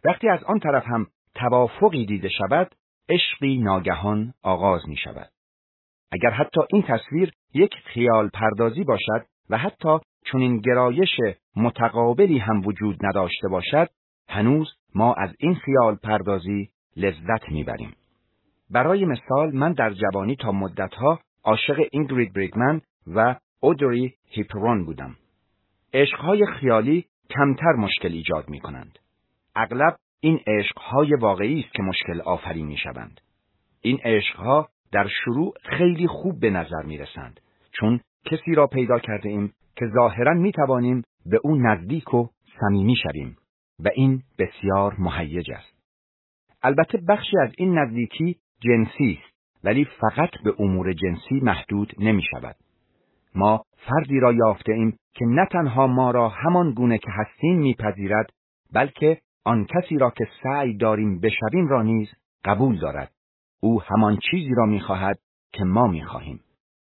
وقتی از آن طرف هم توافقی دیده شود، عشقی ناگهان آغاز می شود. اگر حتی این تصویر یک خیال پردازی باشد و حتی چنین گرایش متقابلی هم وجود نداشته باشد، هنوز ما از این خیال پردازی لذت میبریم. برای مثال من در جوانی تا مدتها عاشق اینگرید برگمن و اودری هیپرون بودم. عشقهای خیالی کمتر مشکل ایجاد می کنند. اغلب این عشقهای واقعی است که مشکل آفرین می شوند. این عشقها در شروع خیلی خوب به نظر می رسند، چون کسی را پیدا کرده ایم که ظاهراً می توانیم به او نزدیک و صمیمی شویم و این بسیار مهیج است. البته بخشی از این نزدیکی جنسی است، ولی فقط به امور جنسی محدود نمی شود. ما فردی را یافته ایم که نه تنها ما را همان گونه که هستیم میپذیرد، بلکه آن کسی را که سعی داریم بشویم را نیز قبول دارد. او همان چیزی را میخواهد که ما میخواهیم.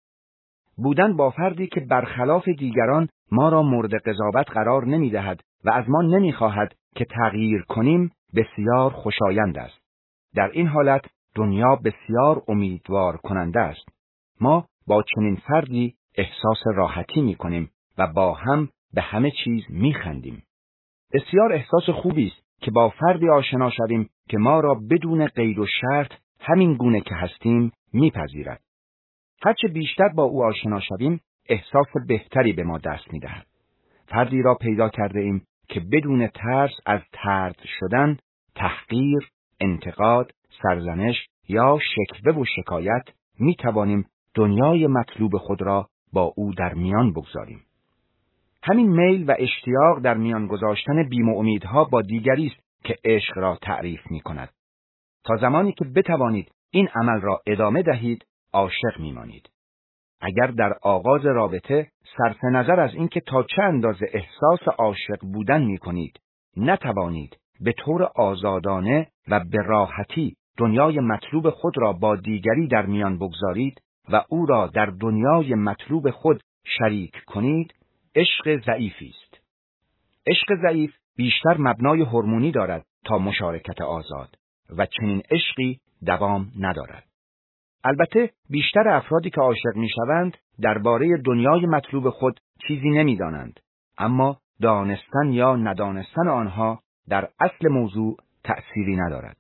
بودن با فردی که برخلاف دیگران ما را مورد قضاوت قرار نمیدهد و از ما نمیخواهد که تغییر کنیم بسیار خوشایند است. در این حالت دنیا بسیار امیدوار کننده است. ما با چنین فردی احساس راحتی میکنیم و با هم به همه چیز میخندیم. بسیار احساس خوبی است که با فردی آشنا شویم که ما را بدون قید و شرط همین گونه که هستیم میپذیرد. هرچه بیشتر با او آشنا شویم، احساس بهتری به ما دست میدهد. فردی را پیدا کرده ایم که بدون ترس از طرد شدن، تحقیر، انتقاد، سرزنش یا شکوه و شکایت میتوانیم دنیای مطلوب خود را با او در میان بگذاریم. همین میل و اشتیاق در میان گذاشتن بیم و امیدها با دیگری است که عشق را تعریف می کند. تا زمانی که بتوانید این عمل را ادامه دهید، عاشق میمانید. اگر در آغاز رابطه صرف نظر از اینکه تا چه اندازه احساس عاشق بودن می کنید، نتوانید به طور آزادانه و به راحتی دنیای مطلوب خود را با دیگری در میان بگذارید و او را در دنیای مطلوب خود شریک کنید، عشق ضعیفی است. عشق ضعیف بیشتر مبنای هورمونی دارد تا مشارکت آزاد و چنین عشقی دوام ندارد. البته بیشتر افرادی که عاشق میشوند درباره دنیای مطلوب خود چیزی نمیدانند، اما دانستن یا ندانستن آنها در اصل موضوع تأثیری ندارد.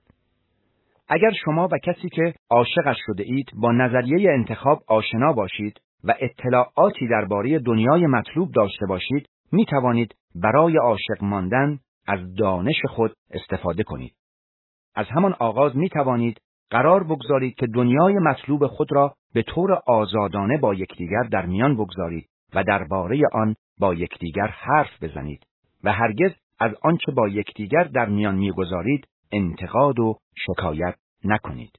اگر شما و کسی که عاشقش شده اید با نظریه انتخاب آشنا باشید و اطلاعاتی درباره دنیای مطلوب داشته باشید، می توانید برای عاشق ماندن از دانش خود استفاده کنید. از همان آغاز می توانید قرار بگذارید که دنیای مطلوب خود را به طور آزادانه با یکدیگر در میان بگذارید و درباره آن با یکدیگر حرف بزنید و هرگز از آنچه با یکدیگر در میان میگذارید انتقاد و شکایت نکنید.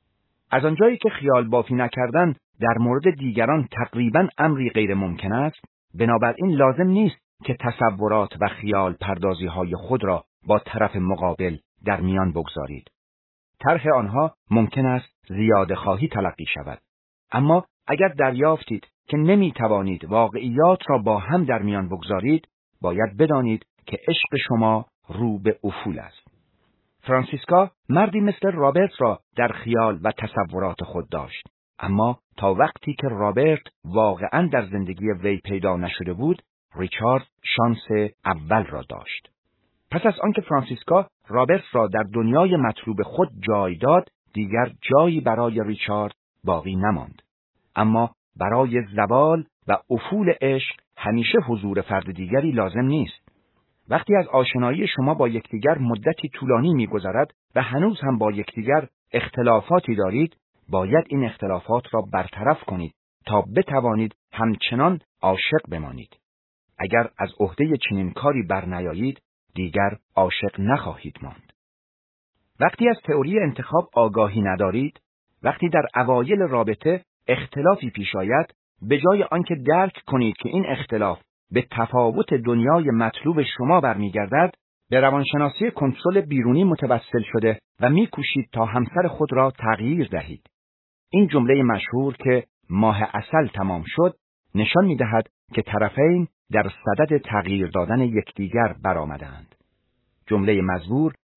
از آنجایی که خیال بافی نکردن در مورد دیگران تقریباً امری غیر ممکن است، بنابراین لازم نیست که تصورات و خیال پردازی های خود را با طرف مقابل در میان بگذارید. طرح آنها ممکن است زیاده خواهی تلقی شود، اما اگر دریافتید که نمی توانید واقعیات را با هم در میان بگذارید، باید بدانید که عشق شما رو به افول است. فرانسیسکا مردی مثل رابرت را در خیال و تصورات خود داشت، اما تا وقتی که رابرت واقعاً در زندگی وی پیدا نشده بود، ریچارد شانس اول را داشت. پس از آنکه فرانسیسکا رابرت را در دنیای مطلوب خود جای داد، دیگر جایی برای ریچارد باقی نماند. اما برای زوال و افول عشق همیشه حضور فرد دیگری لازم نیست. وقتی از آشنایی شما با یکدیگر مدتی طولانی می‌گذرد و هنوز هم با یکدیگر اختلافاتی دارید، باید این اختلافات را برطرف کنید تا بتوانید همچنان عاشق بمانید. اگر از عهده چنین کاری برنیایید، دیگر عاشق نخواهید ماند. وقتی از تئوری انتخاب آگاهی ندارید، وقتی در اوایل رابطه اختلافی پیش آید، به جای آنکه درک کنید که این اختلاف به تفاوت دنیای مطلوب شما برمیگردد، به روانشناسی کنترل بیرونی متوسل شده و میکوشید تا همسر خود را تغییر دهید. این جمله مشهور که ماه عسل تمام شد، نشان می‌دهد که طرفین در صدد تغییر دادن یکدیگر برآمدند. جمله مزبور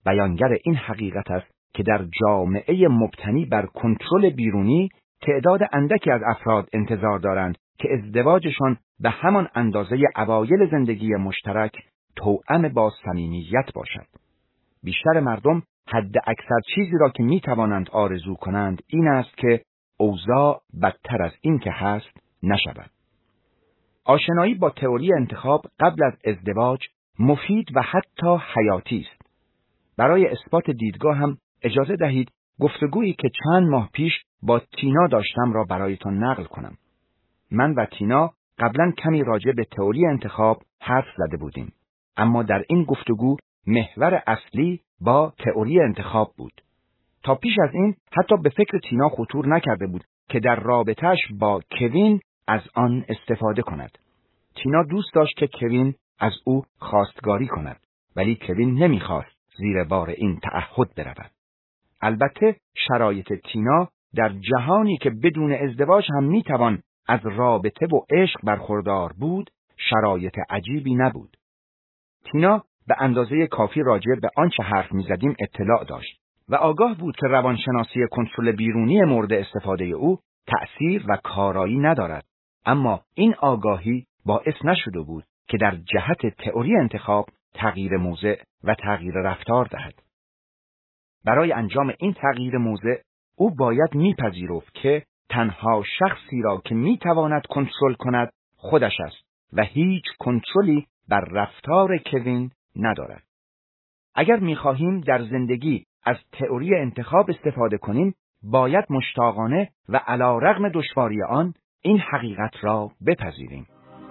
بیانگر این حقیقت است که در جامعه مبتنی بر کنترل بیرونی تعداد اندکی از افراد انتظار دارند که ازدواجشان به همان اندازه اوایل زندگی مشترک توأم با صمیمیت باشد. بیشتر مردم حد اکثر چیزی را که می توانند آرزو کنند این است که اوضاع بدتر از این که هست نشود. آشنایی با تئوری انتخاب قبل از ازدواج مفید و حتی حیاتی است. برای اثبات دیدگاه هم اجازه دهید گفتگویی که چند ماه پیش با تینا داشتم را برایتان نقل کنم. من و تینا قبلا کمی راجع به تئوری انتخاب حرف زده بودیم، اما در این گفتگو محور اصلی با تئوری انتخاب بود. تا پیش از این حتی به فکر تینا خطور نکرده بود که در رابطه‌اش با کوین از آن استفاده کند. تینا دوست داشت که کوین از او خواستگاری کند، ولی کوین نمیخواست زیر بار این تعهد برود. البته شرایط تینا در جهانی که بدون ازدواج هم میتوان از رابطه و عشق برخوردار بود، شرایط عجیبی نبود. تینا به اندازه کافی راجع به آنچه حرف میزدیم اطلاع داشت و آگاه بود که روانشناسی کنترل بیرونی مورد استفاده او تأثیر و کارایی ندارد، اما این آگاهی باعث نشده بود که در جهت تئوری انتخاب تغییر موضع و تغییر رفتار دهد. برای انجام این تغییر موضع او باید میپذیرفت که تنها شخصی را که میتواند کنترل کند خودش است و هیچ کنترلی بر رفتار کوین ندارد. اگر میخواهیم در زندگی از تئوری انتخاب استفاده کنیم، باید مشتاقانه و علی رغم دشواری آن این حقیقت را بپذیریم.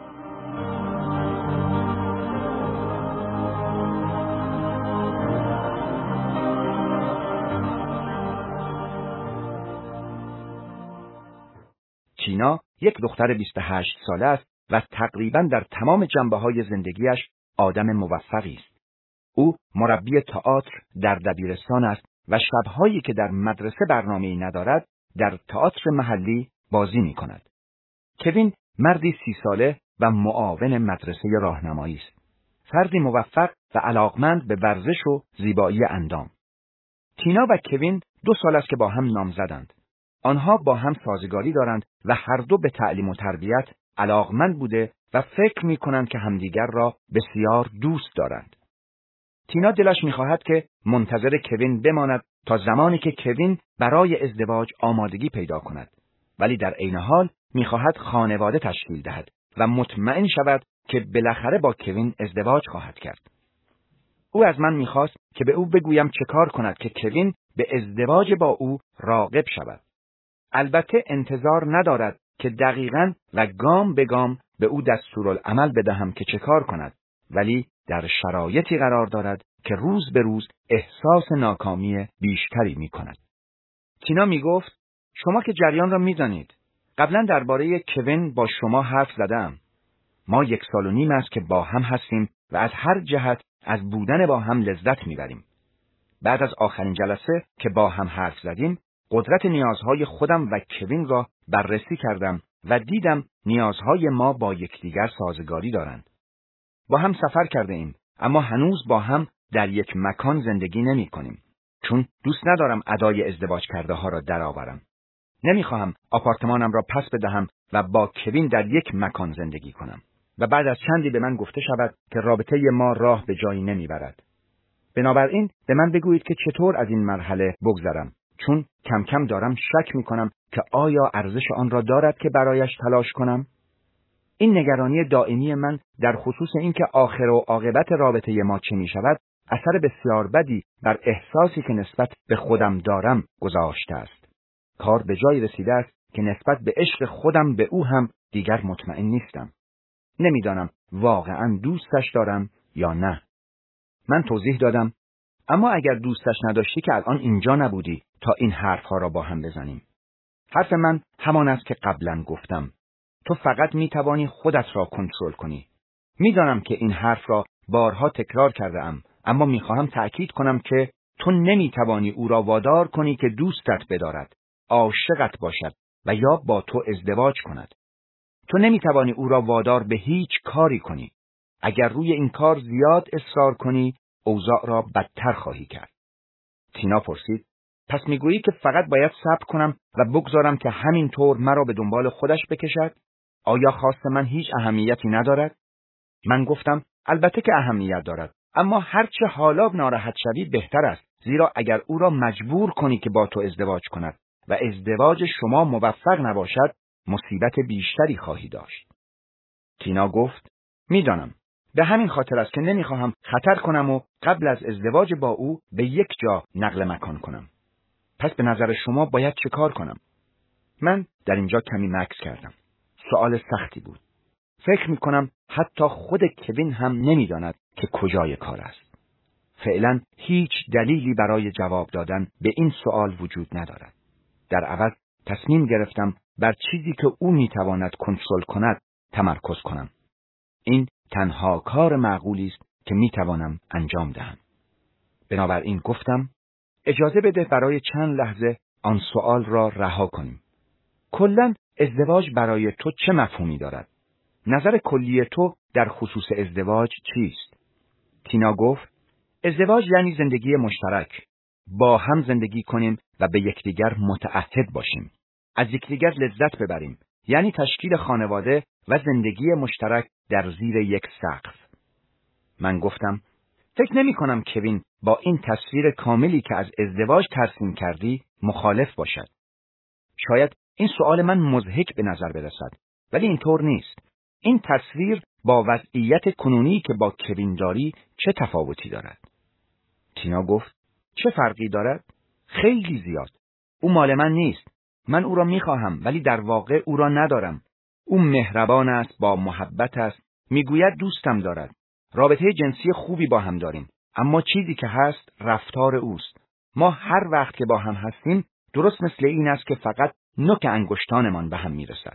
تینا یک دختر بیست و هشت ساله است و تقریباً در تمام جنبه‌های زندگیش آدم موفقی است. او مربی تئاتر در دبیرستان است و شب‌هایی که در مدرسه برنامه‌ای ندارد، در تئاتر محلی بازی می‌کند. کوین مردی سی ساله و معاون مدرسه راهنمایی است. فردی موفق و علاقمند به ورزش و زیبایی اندام. تینا و کوین دو سال است که با هم نامزدند. آنها با هم سازگاری دارند و هر دو به تعلیم و تربیت علاقمند بوده و فکر می‌کنند که همدیگر را بسیار دوست دارند. تینا دلش می‌خواهد که منتظر کوین بماند تا زمانی که کوین برای ازدواج آمادگی پیدا کند، ولی در عین حال می‌خواهد خانواده تشکیل دهد و مطمئن شود که بالاخره با کوین ازدواج خواهد کرد. او از من می‌خواست که به او بگویم چه کار کند که کوین به ازدواج با او راغب شود. البته انتظار ندارد که دقیقاً و گام به گام به او دستورالعمل بدهم که چه کار کند، ولی در شرایطی قرار دارد که روز به روز احساس ناکامی بیشتری می کند. تینا می گفت شما که جریان را می دانید. قبلا درباره کوین با شما حرف زدم. ما یک سال و نیم است که با هم هستیم و از هر جهت از بودن با هم لذت می بریم. بعد از آخرین جلسه که با هم حرف زدیم، قدرت نیازهای خودم و کوین را بررسی کردم و دیدم نیازهای ما با یکدیگر سازگاری دارند. با هم سفر کرده ایم، اما هنوز با هم در یک مکان زندگی نمی کنیم، چون دوست ندارم ادای ازدواج کرده ها را درآورم. نمیخواهم آپارتمانم را پس بدهم و با کوین در یک مکان زندگی کنم و بعد از چندی به من گفته شود که رابطه ما راه به جایی نمیبرد. بنابراین به من بگویید که چطور از این مرحله بگذرم، چون کم کم دارم شک میکنم که آیا ارزش آن را دارد که برایش تلاش کنم؟ این نگرانی دائمی من در خصوص اینکه آخر و عاقبت رابطه ما چه می شود، اثر بسیار بدی بر احساسی که نسبت به خودم دارم گذاشته است. کار به جایی رسیده است که نسبت به عشق خودم به او هم دیگر مطمئن نیستم. نمیدانم واقعا دوستش دارم یا نه. من توضیح دادم، اما اگر دوستش نداشتی که الان اینجا نبودی تا این حرفها را با هم بزنیم. حرف من همان است که قبلا گفتم. تو فقط می توانی خودت را کنترل کنی. میدانم که این حرف را بارها تکرار کرده ام، اما می خواهم تأکید کنم که تو نمی توانی او را وادار کنی که دوستت بدارد، عاشقت باشد و یا با تو ازدواج کند. تو نمی توانی او را وادار به هیچ کاری کنی. اگر روی این کار زیاد اصرار کنی، اوضاع را بدتر خواهی کرد. تینا پرسید: پس میگویی که فقط باید صبر کنم و بگذارم که همینطور مرا به دنبال خودش بکشد؟ آیا خواست من هیچ اهمیتی ندارد؟ من گفتم: البته که اهمیت دارد، اما هرچه حالا ناراحت شوی بهتر است، زیرا اگر او را مجبور کنی که با تو ازدواج کند و ازدواج شما موفق نباشد، مصیبت بیشتری خواهی داشت. تینا گفت: میدانم. به همین خاطر است که نمیخواهم خطر کنم و قبل از ازدواج با او به یک جا نقل مکان کنم. پس به نظر شما باید چه کار کنم؟ من در اینجا کمی مکث کردم. سوال سختی بود. فکر میکنم حتی خود کوین هم نمیداند که کجای کار است. فعلا هیچ دلیلی برای جواب دادن به این سوال وجود ندارد. در عوض تصمیم گرفتم بر چیزی که او میتواند کنترل کند تمرکز کنم. این تنها کار معقولی است که میتوانم انجام دهم. بنابراین گفتم: اجازه بده برای چند لحظه آن سوال را رها کنیم. کلاً ازدواج برای تو چه مفهومی دارد؟ نظر کلی تو در خصوص ازدواج چیست؟ تینا گفت: ازدواج یعنی زندگی مشترک. با هم زندگی کنیم و به یکدیگر متعهد باشیم. از یکدیگر لذت ببریم. یعنی تشکیل خانواده و زندگی مشترک در زیر یک سقف. من گفتم: فکر نمی کنم کوین با این تصویر کاملی که از ازدواج ترسیم کردی مخالف باشد. شاید این سوال من مضحک به نظر برسد، ولی اینطور نیست. این تصویر با وضعیت کنونی که با کوین داری چه تفاوتی دارد؟ تینا گفت: چه فرقی دارد؟ خیلی زیاد. او مال من نیست. من او را میخواهم ولی در واقع او را ندارم. او مهربان است، با محبت است، میگوید دوستم دارد. رابطه جنسی خوبی با هم داریم، اما چیزی که هست رفتار اوست. ما هر وقت که با هم هستیم درست مثل این است که فقط نوک انگشتانمان به هم میرسد.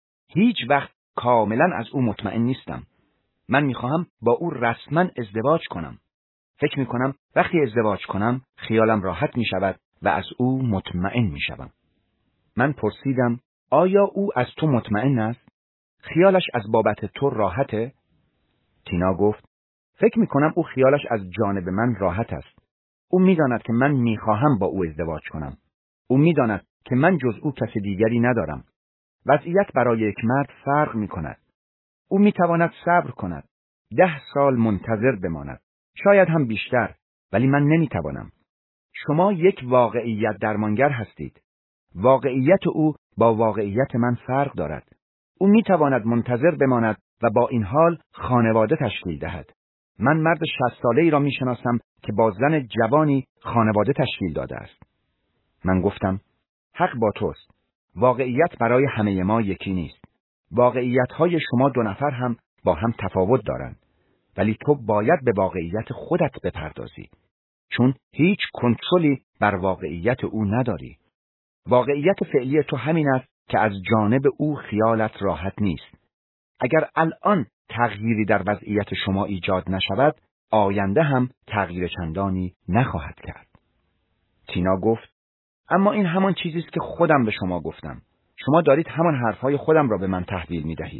هیچ وقت کاملا از او مطمئن نیستم. من میخواهم با او رسما ازدواج کنم. فکر میکنم وقتی ازدواج کنم خیالم راحت میشود و از او مطمئن میشوم. من پرسیدم: آیا او از تو مطمئن است؟ خیالش از بابت تو راحته؟ تینا گفت: فکر میکنم او خیالش از جانب من راحت است. او میداند که من میخواهم با او ازدواج کنم. او میداند که من جز او کس دیگری ندارم. وضعیت برای یک مرد فرق میکند. او میتواند صبر کند. ده سال منتظر بماند. شاید هم بیشتر، ولی من نمیتوانم. شما یک واقعیت درمانگر هستید. واقعیت او با واقعیت من فرق دارد. او میتواند منتظر بماند و با این حال خانواده تشکیل دهد. من مرد شصت ساله ای را میشناسم که با زن جوانی خانواده تشکیل داده است. من گفتم: حق با توست. واقعیت برای همه ما یکی نیست. واقعیت‌های شما دو نفر هم با هم تفاوت دارند. ولی تو باید به واقعیت خودت بپردازی. چون هیچ کنترلی بر واقعیت او نداری. واقعیت فعلی تو همین است که از جانب او خیالت راحت نیست. اگر الان تغییری در وضعیت شما ایجاد نشود، آینده هم تغییر چندانی نخواهد کرد. تینا گفت: اما این همان چیزی است که خودم به شما گفتم. شما دارید همان حرفهای خودم را به من تحویل می دهید.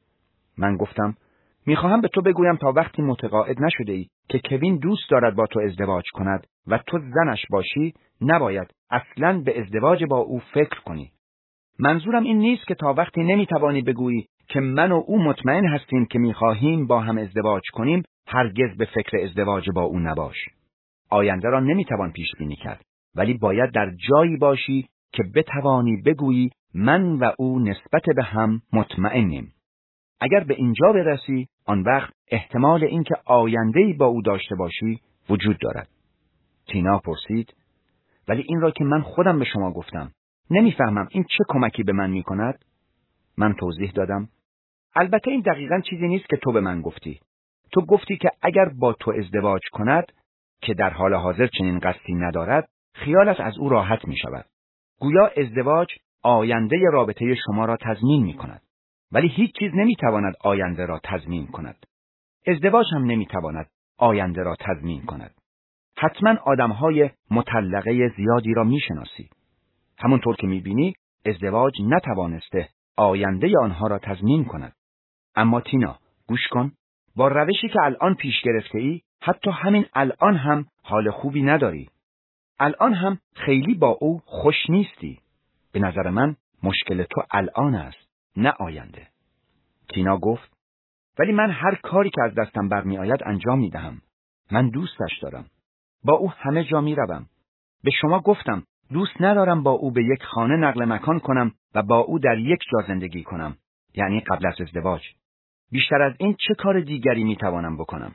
من گفتم: میخواهم به تو بگویم تا وقتی متقاعد نشده ای که کوین دوست دارد با تو ازدواج کند و تو زنش باشی، نباید اصلاً به ازدواج با او فکر کنی. منظورم این نیست که تا وقتی نمیتوانی بگویی که من و او مطمئن هستیم که میخواهیم با هم ازدواج کنیم، هرگز به فکر ازدواج با او نباش. آینده را نمیتوان پیش بینی کرد، ولی باید در جایی باشی که بتوانی بگویی من و او نسبت به هم مطمئنیم. اگر به اینجا برسی، آن وقت احتمال اینکه آینده‌ای با او داشته باشی وجود دارد. تینا پرسید: ولی این را که من خودم به شما گفتم، نمیفهمم این چه کمکی به من میکند؟ من توضیح دادم: البته این دقیقاً چیزی نیست که تو به من گفتی. تو گفتی که اگر با تو ازدواج کند، که در حال حاضر چنین قصدی ندارد، خیالش از او راحت می شود. گویا ازدواج آینده رابطه شما را تضمین می کند. ولی هیچ چیز نمی تواند آینده را تضمین کند. ازدواج هم نمی تواند آینده را تضمین کند. حتما آدمهای مطلقه زیادی را می شناسی. همونطور که می بینی، ازدواج نتوانسته آینده آنها را تضمین کند. اما تینا، گوش کن، با روشی که الان پیش گرفته ای، حتی همین الان هم حال خوبی نداری. الان هم خیلی با او خوش نیستی. به نظر من مشکل تو الان است، نه آینده. تینا گفت: ولی من هر کاری که از دستم برمی آید انجام می دهم. من دوستش دارم. با او همه جا می روم. به شما گفتم دوست ندارم با او به یک خانه نقل مکان کنم و با او در یک جا زندگی کنم، یعنی قبل از ازدواج. بیشتر از این چه کار دیگری می توانم بکنم؟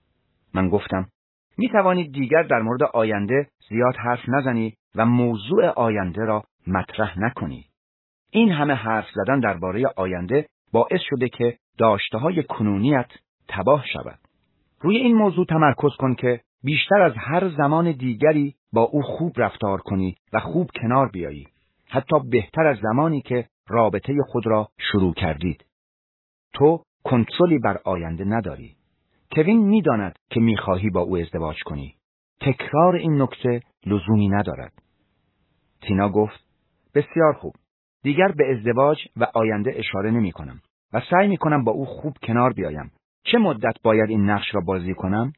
من گفتم: می توانید دیگر در مورد آینده زیاد حرف نزنی و موضوع آینده را مطرح نکنی. این همه حرف زدن درباره آینده باعث شده که داشته‌های کنونیت تباه شود. روی این موضوع تمرکز کن که بیشتر از هر زمان دیگری با او خوب رفتار کنی و خوب کنار بیایی، حتی بهتر از زمانی که رابطه خود را شروع کردید. تو کنترلی بر آینده نداری. کوین می‌داند که می‌خواهی با او ازدواج کنی. تکرار این نکته لزومی ندارد. تینا گفت: بسیار خوب. دیگر به ازدواج و آینده اشاره نمی کنم و سعی می کنم با او خوب کنار بیایم. چه مدت باید این نقش را بازی کنم؟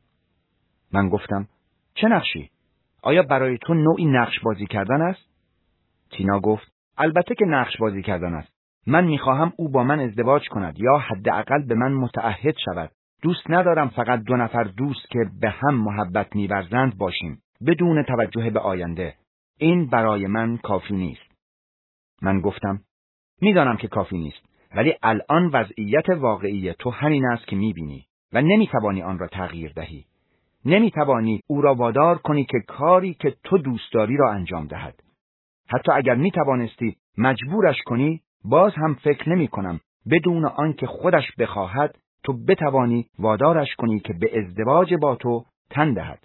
من گفتم: چه نقشی؟ آیا برای تو نوعی نقش بازی کردن است؟ تینا گفت: البته که نقش بازی کردن است. من می خواهم او با من ازدواج کند یا حداقل به من متعهد شود. دوست ندارم فقط دو نفر دوست که به هم محبت می ورزند باشیم بدون توجه به آینده. این برای من کافی نیست. من گفتم: میدانم که کافی نیست، ولی الان وضعیت واقعی تو همین است که میبینی و نمیتوانی آن را تغییر دهی. نمیتوانی او را وادار کنی که کاری که تو دوست داری را انجام دهد. حتی اگر میتوانستی مجبورش کنی، باز هم فکر نمی کنم بدون آنکه خودش بخواهد تو بتوانی وادارش کنی که به ازدواج با تو تن دهد.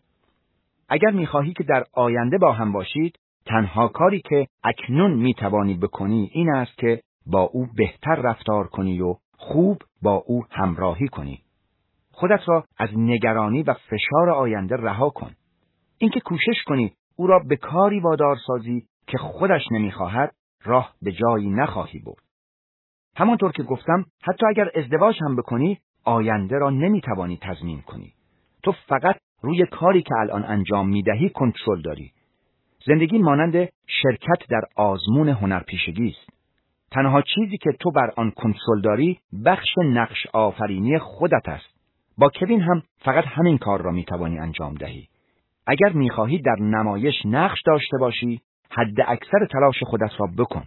اگر میخواهی که در آینده با هم باشید، تنها کاری که اکنون میتوانی بکنی این است که با او بهتر رفتار کنی و خوب با او همراهی کنی. خودت را از نگرانی و فشار آینده رها کن. اینکه کوشش کنی او را به کاری وادار سازی که خودش نمیخواهد، راه به جایی نخواهی برد. همانطور که گفتم، حتی اگر ازدواج هم بکنی، آینده را نمیتوانی تضمین کنی. تو فقط روی کاری که الان انجام میدهی کنترل داری. زندگی مانند شرکت در آزمون هنرپیشگی است. تنها چیزی که تو بر آن کنترل داری بخش نقش آفرینی خودت است. با کوین هم فقط همین کار را میتوانی انجام دهی. اگر میخواهی در نمایش نقش داشته باشی، حد اکثر تلاش خودت را بکن.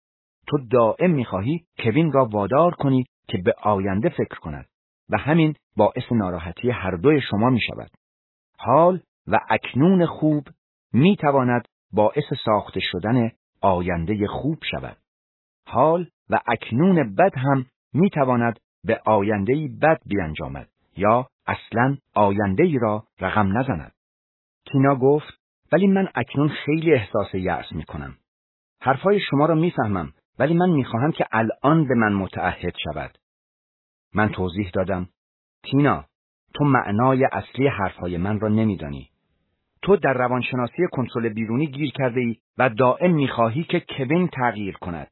تو دائم میخواهی کوین را وادار کنی که به آینده فکر کند و همین باعث ناراحتی هر دوی شما میشود. حال و اکنون خوب میتواند باعث ساخته شدن آینده خوب شود. حال و اکنون بد هم میتواند به آینده‌ای بد بیانجامد یا اصلاً آینده‌ای را رقم نزند. تینا گفت: ولی من اکنون خیلی احساس یأس میکنم. حرفای شما را میفهمم، ولی من میخواهم که الان به من متعهد شود. من توضیح دادم: تینا، تو معنای اصلی حرفهای من را نمیدانی. تو در روانشناسی کنترل بیرونی گیر کرده ای و دائم میخواهی که کوین تغییر کند.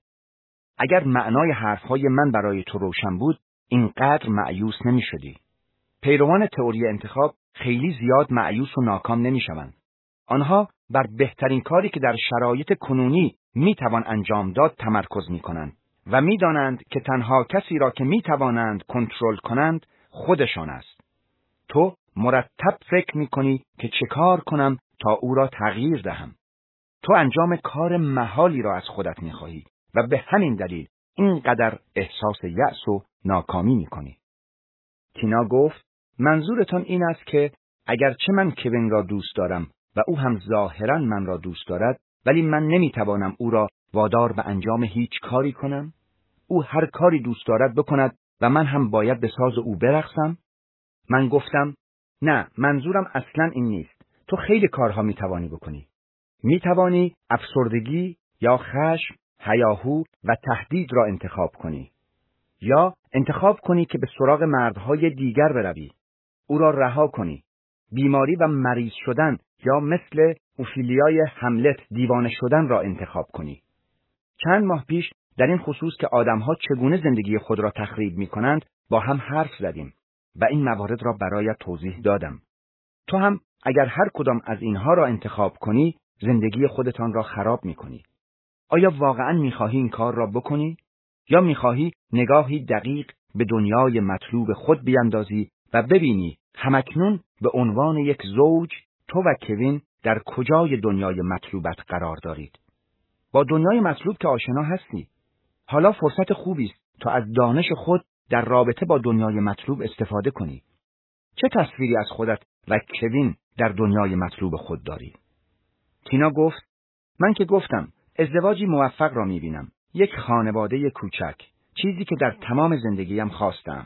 اگر معنای حرفهای من برای تو روشن بود، اینقدر مایوس نمیشدی. پیروان تئوری انتخاب خیلی زیاد مایوس و ناکام نمیشوند. آنها بر بهترین کاری که در شرایط کنونی میتوان انجام داد تمرکز میکنند و میدانند که تنها کسی را که میتوانند کنترل کنند خودشان است. تو مرتب فکر میکنی که چه کار کنم تا او را تغییر دهم. تو انجام کار محالی را از خودت میخواهی و به همین دلیل اینقدر احساس یأس و ناکامی میکنی. تینا گفت: منظورتان این است که اگرچه من کوین را دوست دارم و او هم ظاهراً من را دوست دارد، ولی من نمیتوانم او را وادار به انجام هیچ کاری کنم؟ او هر کاری دوست دارد بکند و من هم باید به ساز او برقصم؟ من گفتم: نه، منظورم اصلاً این نیست. تو خیلی کارها میتوانی بکنی. میتوانی افسردگی یا خشم، هیاهو و تهدید را انتخاب کنی. یا انتخاب کنی که به سراغ مردهای دیگر بروی. او را رها کنی. بیماری و مریض شدن یا مثل اوفیلیای هملت دیوانه شدن را انتخاب کنی. چند ماه پیش در این خصوص که آدمها چگونه زندگی خود را تخریب می کنند با هم حرف زدیم و این موارد را برایت توضیح دادم. تو هم اگر هر کدام از اینها را انتخاب کنی، زندگی خودتان را خراب میکنی. آیا واقعاً میخواهی این کار را بکنی؟ یا میخواهی نگاهی دقیق به دنیای مطلوب خود بیاندازی و ببینی همکنون به عنوان یک زوج تو و کوین در کجای دنیای مطلوبت قرار دارید؟ با دنیای مطلوب که آشنا هستی. حالا فرصت خوبی است تا از دانش خود در رابطه با دنیای مطلوب استفاده کنی. چه تصویری از خودت و کوین در دنیای مطلوب خود داری؟ تینا گفت: من که گفتم ازدواجی موفق را می‌بینم، یک خانواده کوچک، چیزی که در تمام زندگیم خواستم.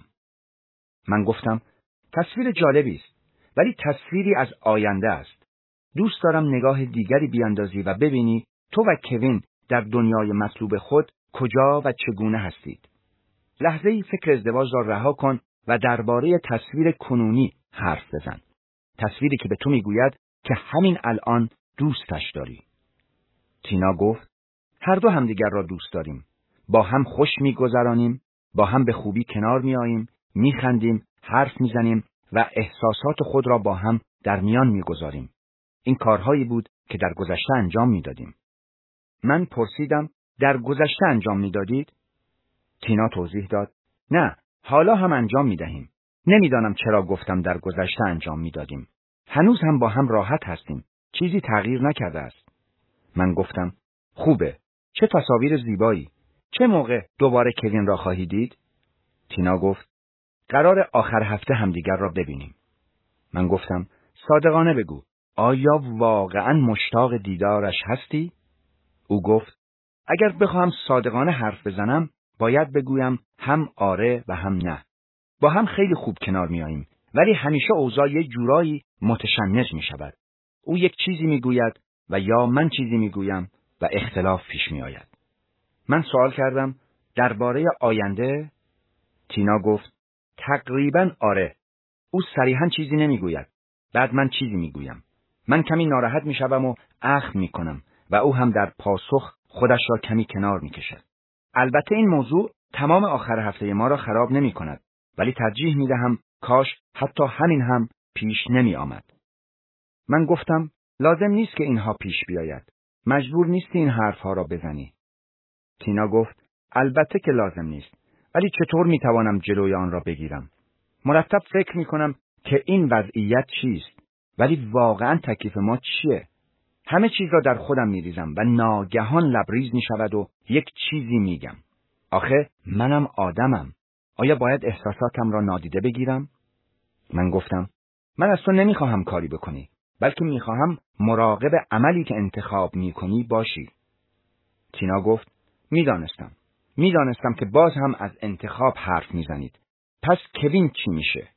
من گفتم: تصویر جالبی است، ولی تصویری از آینده است. دوست دارم نگاه دیگری بیاندازی و ببینی تو و کوین در دنیای مطلوب خود کجا و چگونه هستید. لحظه‌ای فکر ازدواج را رها کن و درباره تصویر کنونی حرف بزن. تصویری که به تو میگوید که همین الان دوستش داری. تینا گفت: هر دو همدیگر را دوست داریم. با هم خوش میگذرانیم، با هم به خوبی کنار میاییم، میخندیم، حرف میزنیم و احساسات خود را با هم در میان میگذاریم. این کارهایی بود که در گذشته انجام میدادیم. من پرسیدم: در گذشته انجام میدادید؟ تینا توضیح داد: نه، حالا هم انجام میدهیم. نمیدانم چرا گفتم در گذشته انجام میدادیم. هنوز هم با هم راحت هستیم. چیزی تغییر نکرده است. من گفتم: خوبه. چه تصاویر زیبایی. چه موقع دوباره کوین را خواهی دید؟ تینا گفت: قرار آخر هفته همدیگر را ببینیم. من گفتم: صادقانه بگو، آیا واقعاً مشتاق دیدارش هستی؟ او گفت: اگر بخواهم صادقانه حرف بزنم، باید بگویم هم آره و هم نه. با هم خیلی خوب کنار میاییم، ولی همیشه اوضاع یه جورایی متشنج می شود. او یک چیزی میگوید و یا من چیزی میگویم و اختلاف پیش می آید. من سوال کردم: درباره آینده؟ تینا گفت: تقریباً آره. او صریحاً چیزی نمیگوید. بعد من چیزی میگویم. من کمی ناراحت میشوم و اخم میکنم و او هم در پاسخ خودش را کمی کنار میکشد. البته این موضوع تمام آخر هفته ما را خراب نمی کند، ولی ترجیح میدهم کاش حتی همین هم پیش نمی آمد. من گفتم: لازم نیست که اینها پیش بیاید. مجبور نیستی این حرفها را بزنی. تینا گفت: البته که لازم نیست، ولی چطور میتوانم جلوی آن را بگیرم؟ مرتب فکر میکنم که این وضعیت چیست، ولی واقعا تکلیف ما چیه؟ همه چیز را در خودم میریزم و ناگهان لبریز میشود و یک چیزی میگم. آخه منم آدمم. آیا باید احساساتم را نادیده بگیرم؟ من گفتم: من از تو نمیخواهم کاری بکنی، بلکه میخواهم مراقب عملی که انتخاب میکنی باشی. تینا گفت: میدانستم. میدانستم که باز هم از انتخاب حرف میزنید. پس کوین چی میشه؟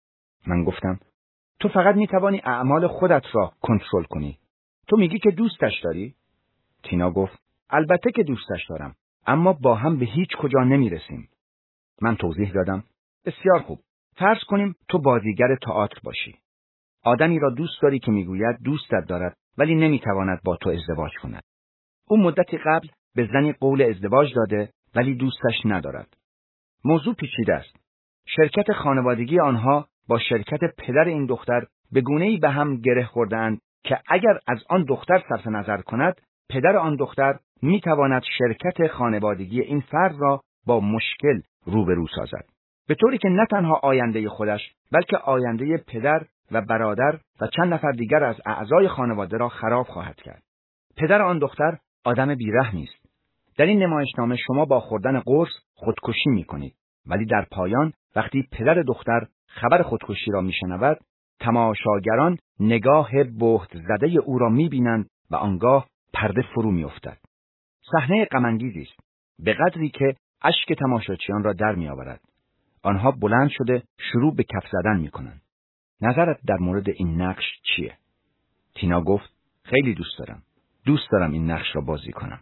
من گفتم: تو فقط میتوانی اعمال خودت را کنترل کنی. تو میگی که دوستش داری؟ تینا گفت: البته که دوستش دارم، اما با هم به هیچ کجا نمیرسیم. من توضیح دادم: بسیار خوب. فرض کنیم تو بازیگر تئاتر باشی. آدمی را دوست داری که میگوید دوستت دارد ولی نمیتواند با تو ازدواج کند. او مدتی قبل به زنی قول ازدواج داده ولی دوستش ندارد. موضوع پیچیده است. شرکت خانوادگی آنها با شرکت پدر این دختر به گونه‌ای به هم گره خورده‌اند که اگر از آن دختر صرف نظر کند، پدر آن دختر میتواند شرکت خانوادگی این فرد را با مشکل روبرو سازد. به طوری که نه تنها آینده خودش، بلکه آینده پدر و برادر و چند نفر دیگر از اعضای خانواده را خراب خواهد کرد. پدر آن دختر آدم بی‌رحمی است. در این نمایشنامه شما با خوردن قرص خودکشی می‌کنید، ولی در پایان وقتی پدر دختر خبر خودکشی را می‌شنود، تماشاگران نگاه بهت زده او را می‌بینند و آنگاه پرده فرو می‌افتد. صحنه غم‌انگیزی است، به قدری که اشک تماشاچیان را در می‌آورد. آنها بلند شده شروع به کف زدن می‌کنند. نظرت در مورد این نقش چیه؟ تینا گفت: خیلی دوست دارم. دوست دارم این نقش را بازی کنم.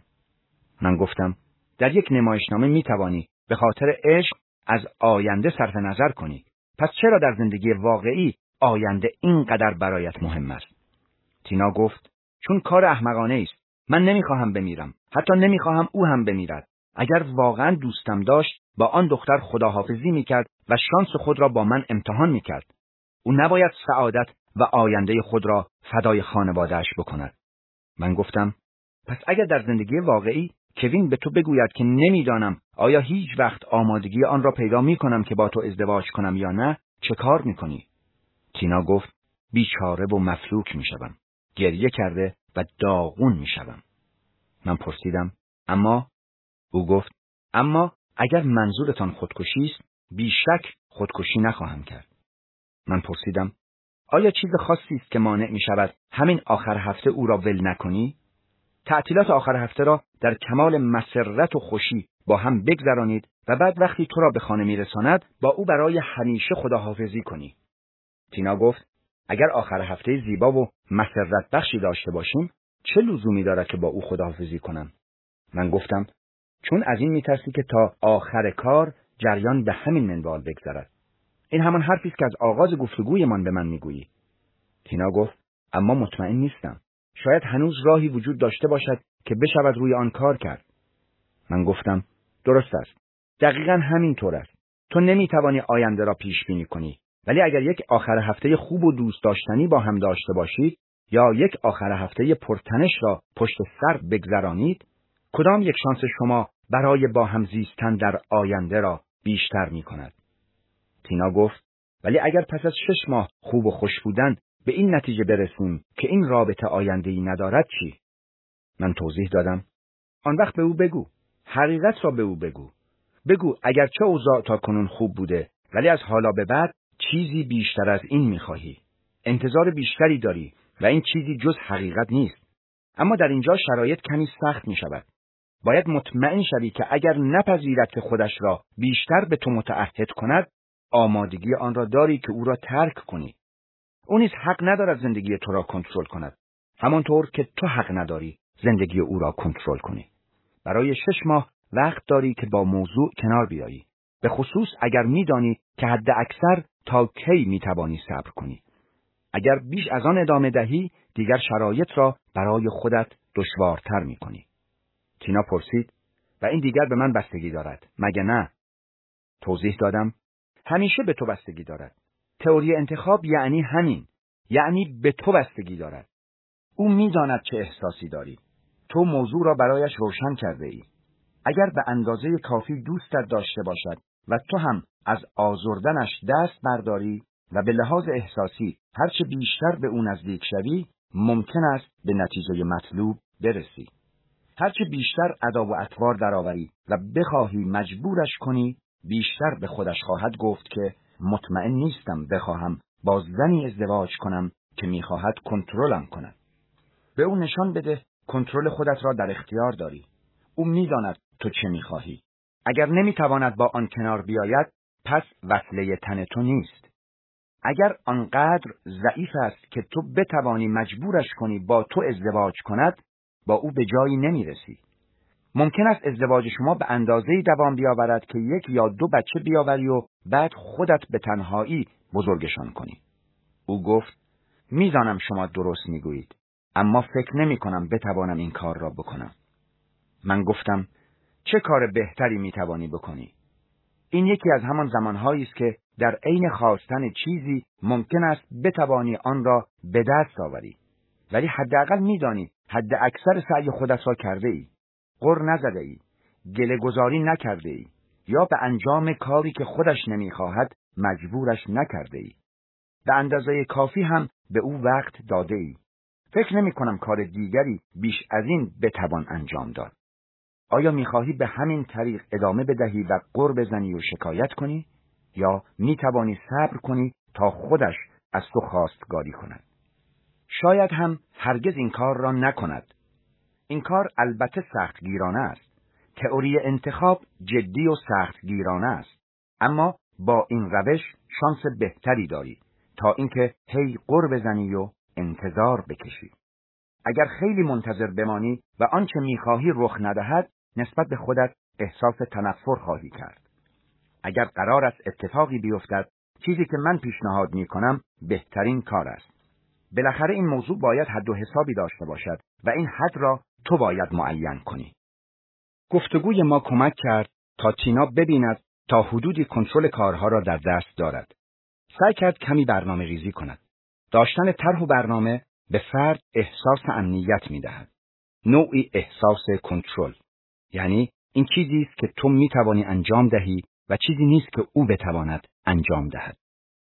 من گفتم: در یک نمایشنامه می‌توانی به خاطر عشق از آینده صرف نظر کنی. پس چرا در زندگی واقعی آینده اینقدر برایت مهم است؟ تینا گفت: چون کار احمقانه است. من نمیخواهم بمیرم. حتی نمیخواهم او هم بمیرد. اگر واقعا دوستم داشت با آن دختر خداحافظی میکرد و شانس خود را با من امتحان میکرد. او نباید سعادت و آینده خود را فدای خانواده‌اش بکند. من گفتم پس اگر در زندگی واقعی کوین به تو بگوید که نمیدانم آیا هیچ وقت آمادگی آن را پیدا می کنم که با تو ازدواج کنم یا نه، چه کار می کنی؟ تینا گفت بیچاره و مفلوک می شدم. گریه کرده و داغون می شدم. من پرسیدم اما؟ او گفت اما اگر منظورتان خودکشی است، بیشک خودکشی نخواهم کرد. من پرسیدم آیا چیز خاصی است که مانع می شود همین آخر هفته او را ول نکنی؟ تعطیلات آخر هفته را در کمال مسرت و خوشی با هم بگذرانید و بعد وقتی تو را به خانه می رساند با او برای همیشه خداحافظی کنی. تینا گفت اگر آخر هفته زیبا و مسرت بخشی داشته باشیم چه لزومی دارد که با او خداحافظی کنم؟ من گفتم چون از این میترسی که تا آخر کار جریان به همین منوال بگذرد. این همان حرفی است که از آغاز گفتگویمان به من میگویی. تینا گفت اما مطمئن نیستم. شاید هنوز راهی وجود داشته باشد که بشود روی آن کار کرد. من گفتم درست است. دقیقاً همین طور است. تو نمیتوانی آینده را پیش بینی کنی، ولی اگر یک آخر هفته خوب و دوست داشتنی با هم داشته باشید یا یک آخر هفته پرتنش را پشت سر بگذرانید، کدام یک شانس شما برای با هم زیستن در آینده را بیشتر می کند؟ تینا گفت ولی اگر پس از شش ماه خوب و خوش بودن به این نتیجه برسیم که این رابطه آینده‌ای ندارد چی؟ من توضیح دادم آن وقت به او بگو. حقیقت را به او بگو. بگو اگرچه اوضاع تا کنون خوب بوده ولی از حالا به بعد چیزی بیشتر از این می‌خواهی. انتظار بیشتری داری و این چیزی جز حقیقت نیست. اما در اینجا شرایط کمی سخت می‌شود. باید مطمئن شوی که اگر نپذیرد که خودش را بیشتر به تو متعهد کند، آمادگی آن را داری که او را ترک کنی. او نیز حق ندارد زندگی تو را کنترل کند، همانطور که تو حق نداری زندگی او را کنترل کنی. برای شش ماه وقت داری که با موضوع کنار بیایی، به خصوص اگر می‌دانی که حد اکثر تا کی می‌توانی صبر کنی. اگر بیش از آن ادامه دهی، دیگر شرایط را برای خودت دشوارتر می‌کنی. تینا پرسید و این دیگر به من بستگی دارد، مگه نه؟ توضیح دادم همیشه به تو بستگی دارد. تئوری انتخاب یعنی همین، یعنی به تو بستگی دارد. او می‌داند چه احساسی داری. تو موضوع را برایش روشن کرده ای. اگر به اندازه کافی دوستت داشته باشد و تو هم از آزردنش دست برداری و به لحاظ احساسی هرچه بیشتر به او نزدیک شوی، ممکن است به نتیجه مطلوب برسی. هرچه بیشتر ادا و اطوار درآوری و بخواهی مجبورش کنی، بیشتر به خودش خواهد گفت که مطمئن نیستم بخواهم با زنی ازدواج کنم که میخواهد کنترلم کند. به او نشان بده کنترل خودت را در اختیار داری. او میداند تو چه میخواهی. اگر نمیتواند با آن کنار بیاید، پس وصله تن تو نیست. اگر آنقدر ضعیف است که تو بتوانی مجبورش کنی با تو ازدواج کند، با او به جایی نمیرسی. ممکن است ازدواج شما به اندازه‌ای دوام بیاورد که یک یا دو بچه بیاوری و بعد خودت به تنهایی بزرگشان کنی. او گفت میدانم شما درست میگویید، اما فکر نمی کنم بتوانم این کار را بکنم. من گفتم چه کار بهتری میتوانی بکنی؟ این یکی از همان زمانهایی است که در عین خواستن چیزی ممکن است بتوانی آن را به دست آوری، ولی حداقل میدانی حد اکثر سعی خودت را کرده ای، غر نزده ای، گله گذاری نکرده ای، یا به انجام کاری که خودش نمیخواهد مجبورش نکرده ای. به اندازه کافی هم به او وقت داده ای. فکر نمی کنم کار دیگری بیش از این بتوان انجام داد. آیا میخواهی به همین طریق ادامه بدهی و غر بزنی و شکایت کنی؟ یا میتوانی صبر کنی تا خودش از تو خواستگاری کند؟ شاید هم هرگز این کار را نکند. این کار البته سختگیرانه است. تئوری انتخاب جدی و سختگیرانه است. اما با این روش شانس بهتری داری تا اینکه هی غر بزنی و انتظار بکشی. اگر خیلی منتظر بمانی و آنچه میخواهی رخ ندهد، نسبت به خودت احساس تنفر خواهی کرد. اگر قرار است اتفاقی بیفتد، چیزی که من پیشنهاد میکنم بهترین کار است. بالاخره این موضوع باید حد و حسابی داشته باشد و این حد را تو باید معین کنی. گفتگوی ما کمک کرد تا تینا ببیند تا حدودی کنترل کارها را در دست دارد. سعی کرد کمی برنامه ریزی کند. داشتن طرح و برنامه به فرد احساس امنیت می‌دهد. نوعی احساس کنترل. یعنی این چیزی است که تو می‌توانی انجام دهی و چیزی نیست که او بتواند انجام دهد.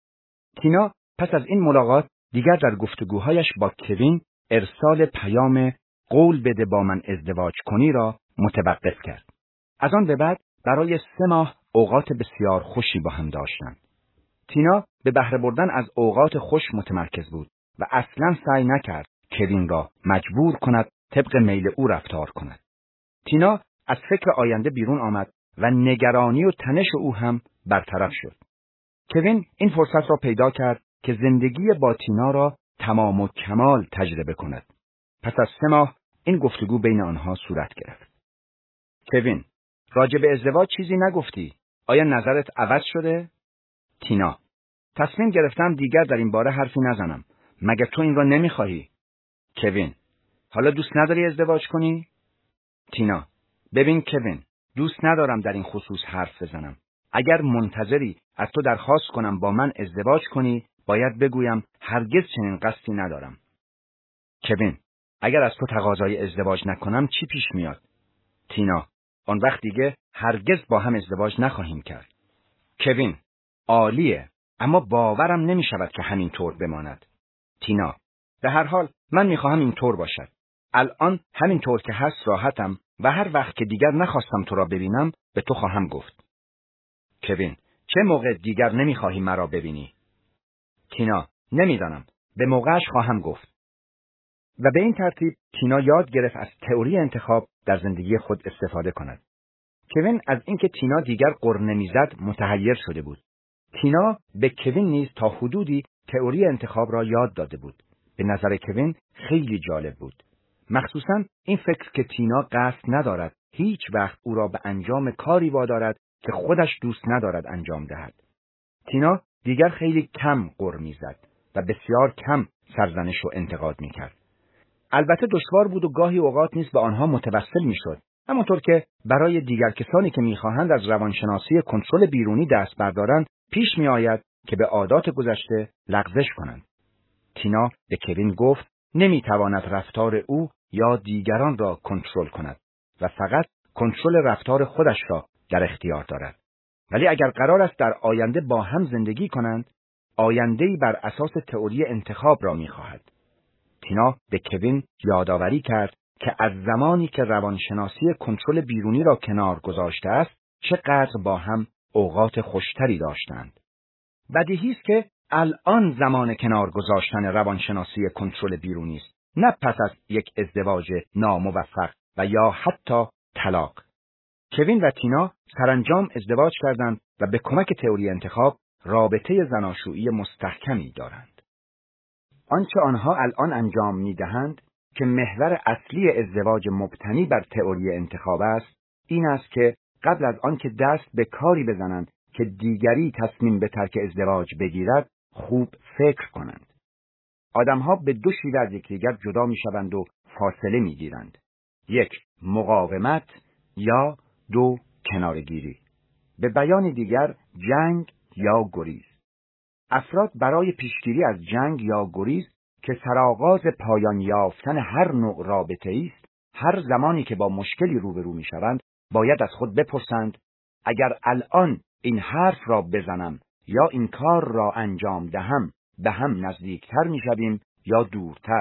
تینا پس از این ملاقات دیگر در گفتگوهایش با کوین ارسال پیام قول بده با من ازدواج کنی را متوقف کرد. از آن به بعد برای سه ماه اوقات بسیار خوشی با هم داشتند. تینا به بهره بردن از اوقات خوش متمرکز بود و اصلاً سعی نکرد کوین را مجبور کند طبق میل او رفتار کند. تینا از فکر آینده بیرون آمد و نگرانی و تنش او هم برطرف شد. کوین این فرصت را پیدا کرد که زندگی با تینا را تمام و کمال تجربه کند. پس از سه ماه این گفتگو بین آنها صورت گرفت. کوین: راجع به ازدواج چیزی نگفتی. آیا نظرت عوض شده؟ تینا: تصمیم گرفتم دیگر در این باره حرفی نزنم. مگر تو این را نمیخواهی؟ کوین: حالا دوست نداری ازدواج کنی؟ تینا: ببین کوین، دوست ندارم در این خصوص حرف بزنم. اگر منتظری از تو درخواست کنم با من ازدواج کنی، باید بگویم هرگز چنین قصدی ندارم. کوین: اگر از تو تقاضای ازدواج نکنم چی پیش میاد؟ تینا: آن وقت دیگه هرگز با هم ازدواج نخواهیم کرد. کوین: عالیه، اما باورم نمی شود که همین طور بماند. تینا: به هر حال من میخواهم این طور باشد. الان همین طور که هست راحتم و هر وقت که دیگر نخواستم تو را ببینم به تو خواهم گفت. کوین: چه موقع دیگر نمیخواهی مرا ببینی؟ تینا: نمیدانم، به موقعش خواهم گفت. و به این ترتیب تینا یاد گرفت از تئوری انتخاب در زندگی خود استفاده کند. کوین از اینکه تینا دیگر غر نمیزد متحیر شده بود. تینا به کوین نیز تا حدودی تئوری انتخاب را یاد داده بود. به نظر کوین خیلی جالب بود. مخصوصاً این فکر که تینا قصد ندارد هیچ وقت او را به انجام کاری وادارد که خودش دوست ندارد انجام دهد. تینا دیگر خیلی کم غر میزد و بسیار کم سرزنش و انتقاد میکرد. البته دشوار بود و گاهی اوقات نیز به آنها متوسل میشد، همانطور که برای دیگر کسانی که میخواهند از روانشناسی کنترل بیرونی دست بردارند پیش میآید که به عادات گذشته لغزش کنند. تینا به کوین گفت نمیتواند رفتار او یا دیگران را کنترل کند و فقط کنترل رفتار خودش را در اختیار دارد. ولی اگر قرار است در آینده با هم زندگی کنند، آینده‌ای بر اساس تئوری انتخاب را میخواهد. تینا به کوین یادآوری کرد که از زمانی که روانشناسی کنترل بیرونی را کنار گذاشته است، چقدر با هم اوقات خوشتری داشتند. بدیهی است که الان زمان کنار گذاشتن روانشناسی کنترل بیرونی است، نه پس از یک ازدواج ناموفق و یا حتی طلاق. کوین و تینا سرانجام ازدواج کردند و به کمک تئوری انتخاب رابطه زناشویی مستحکمی دارند. آنچه آنها الان انجام می‌دهند که محور اصلی ازدواج مبتنی بر تئوری انتخاب است، این است که قبل از آن که دست به کاری بزنند که دیگری تصمیم به ترک ازدواج بگیرد، خوب فکر کنند. آدم‌ها به دو شیوه از یکدیگر جدا می‌شوند و فاصله می‌گیرند. یک، مقاومت یا دو، کناره‌گیری. به بیان دیگر، جنگ یا گریز. افراد برای پیشگیری از جنگ یا گریز که سرآغاز پایان یافتن هر نوع رابطه است، هر زمانی که با مشکلی روبرو می‌شوند، باید از خود بپرسند اگر الان این حرف را بزنم یا این کار را انجام دهم، به هم نزدیکتر می‌شویم یا دورتر.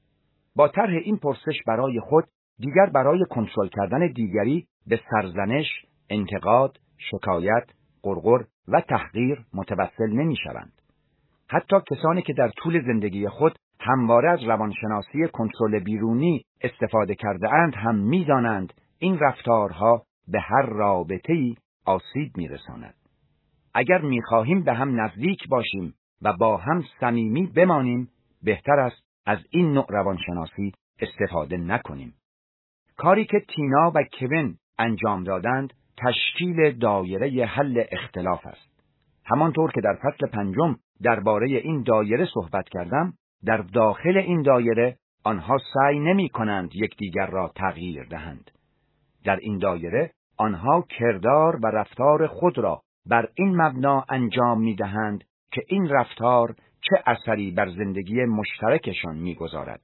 با طرح این پرسش برای خود، دیگر برای کنترل کردن دیگری به سرزنش، انتقاد، شکایت، غرغر و تحقیر متوسل نمی‌شوند. حتی کسانی که در طول زندگی خود همواره از روانشناسی کنترل بیرونی استفاده کرده اند هم می‌دانند این رفتارها به هر رابطه‌ای آسیب می‌رساند. اگر می‌خواهیم به هم نزدیک باشیم و با هم صمیمی بمانیم، بهتر است از این نوع روانشناسی استفاده نکنیم. کاری که تینا و کوین انجام دادند تشکیل دایره حل اختلاف است. همانطور که در فصل پنجم درباره این دایره صحبت کردم، در داخل این دایره آنها سعی نمی کنند یکدیگر را تغییر دهند. در این دایره آنها کردار و رفتار خود را بر این مبنا انجام می دهند که این رفتار چه اثری بر زندگی مشترکشان می‌گذارد.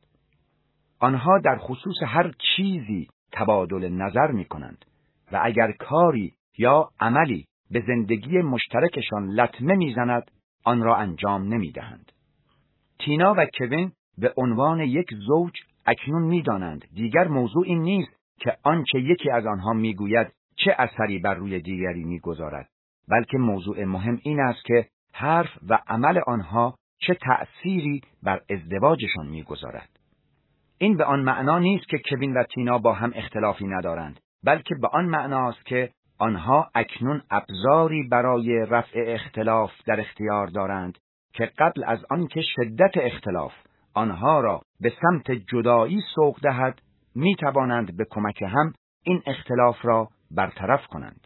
آنها در خصوص هر چیزی تبادل نظر می‌کنند و اگر کاری یا عملی به زندگی مشترکشان لطمه می‌زند، آن را انجام نمی‌دهند. تینا و کوین به عنوان یک زوج اکنون می‌دانند دیگر موضوع این نیست که آنچه یکی از آنها می‌گوید چه اثری بر روی دیگری می‌گذارد، بلکه موضوع مهم این است که حرف و عمل آنها چه تأثیری بر ازدواجشان می‌گذارد. این به آن معنا نیست که کوین و تینا با هم اختلافی ندارند، بلکه به آن معناست که آنها اکنون ابزاری برای رفع اختلاف در اختیار دارند که قبل از آنکه شدت اختلاف آنها را به سمت جدایی سوق دهد، می توانند به کمک هم این اختلاف را برطرف کنند.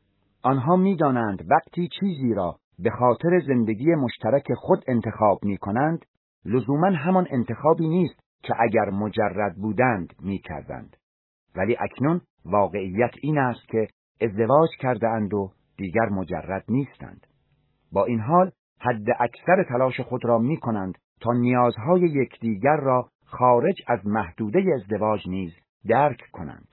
آنها می دانند وقتی چیزی را به خاطر زندگی مشترک خود انتخاب می کنند، لزوماً همان انتخابی نیست که اگر مجرد بودند می کردند. ولی اکنون واقعیت این است که ازدواج کرده اند و دیگر مجرد نیستند. با این حال حد اکثر تلاش خود را می کنند تا نیازهای یکدیگر را خارج از محدوده ازدواج نیز درک کنند.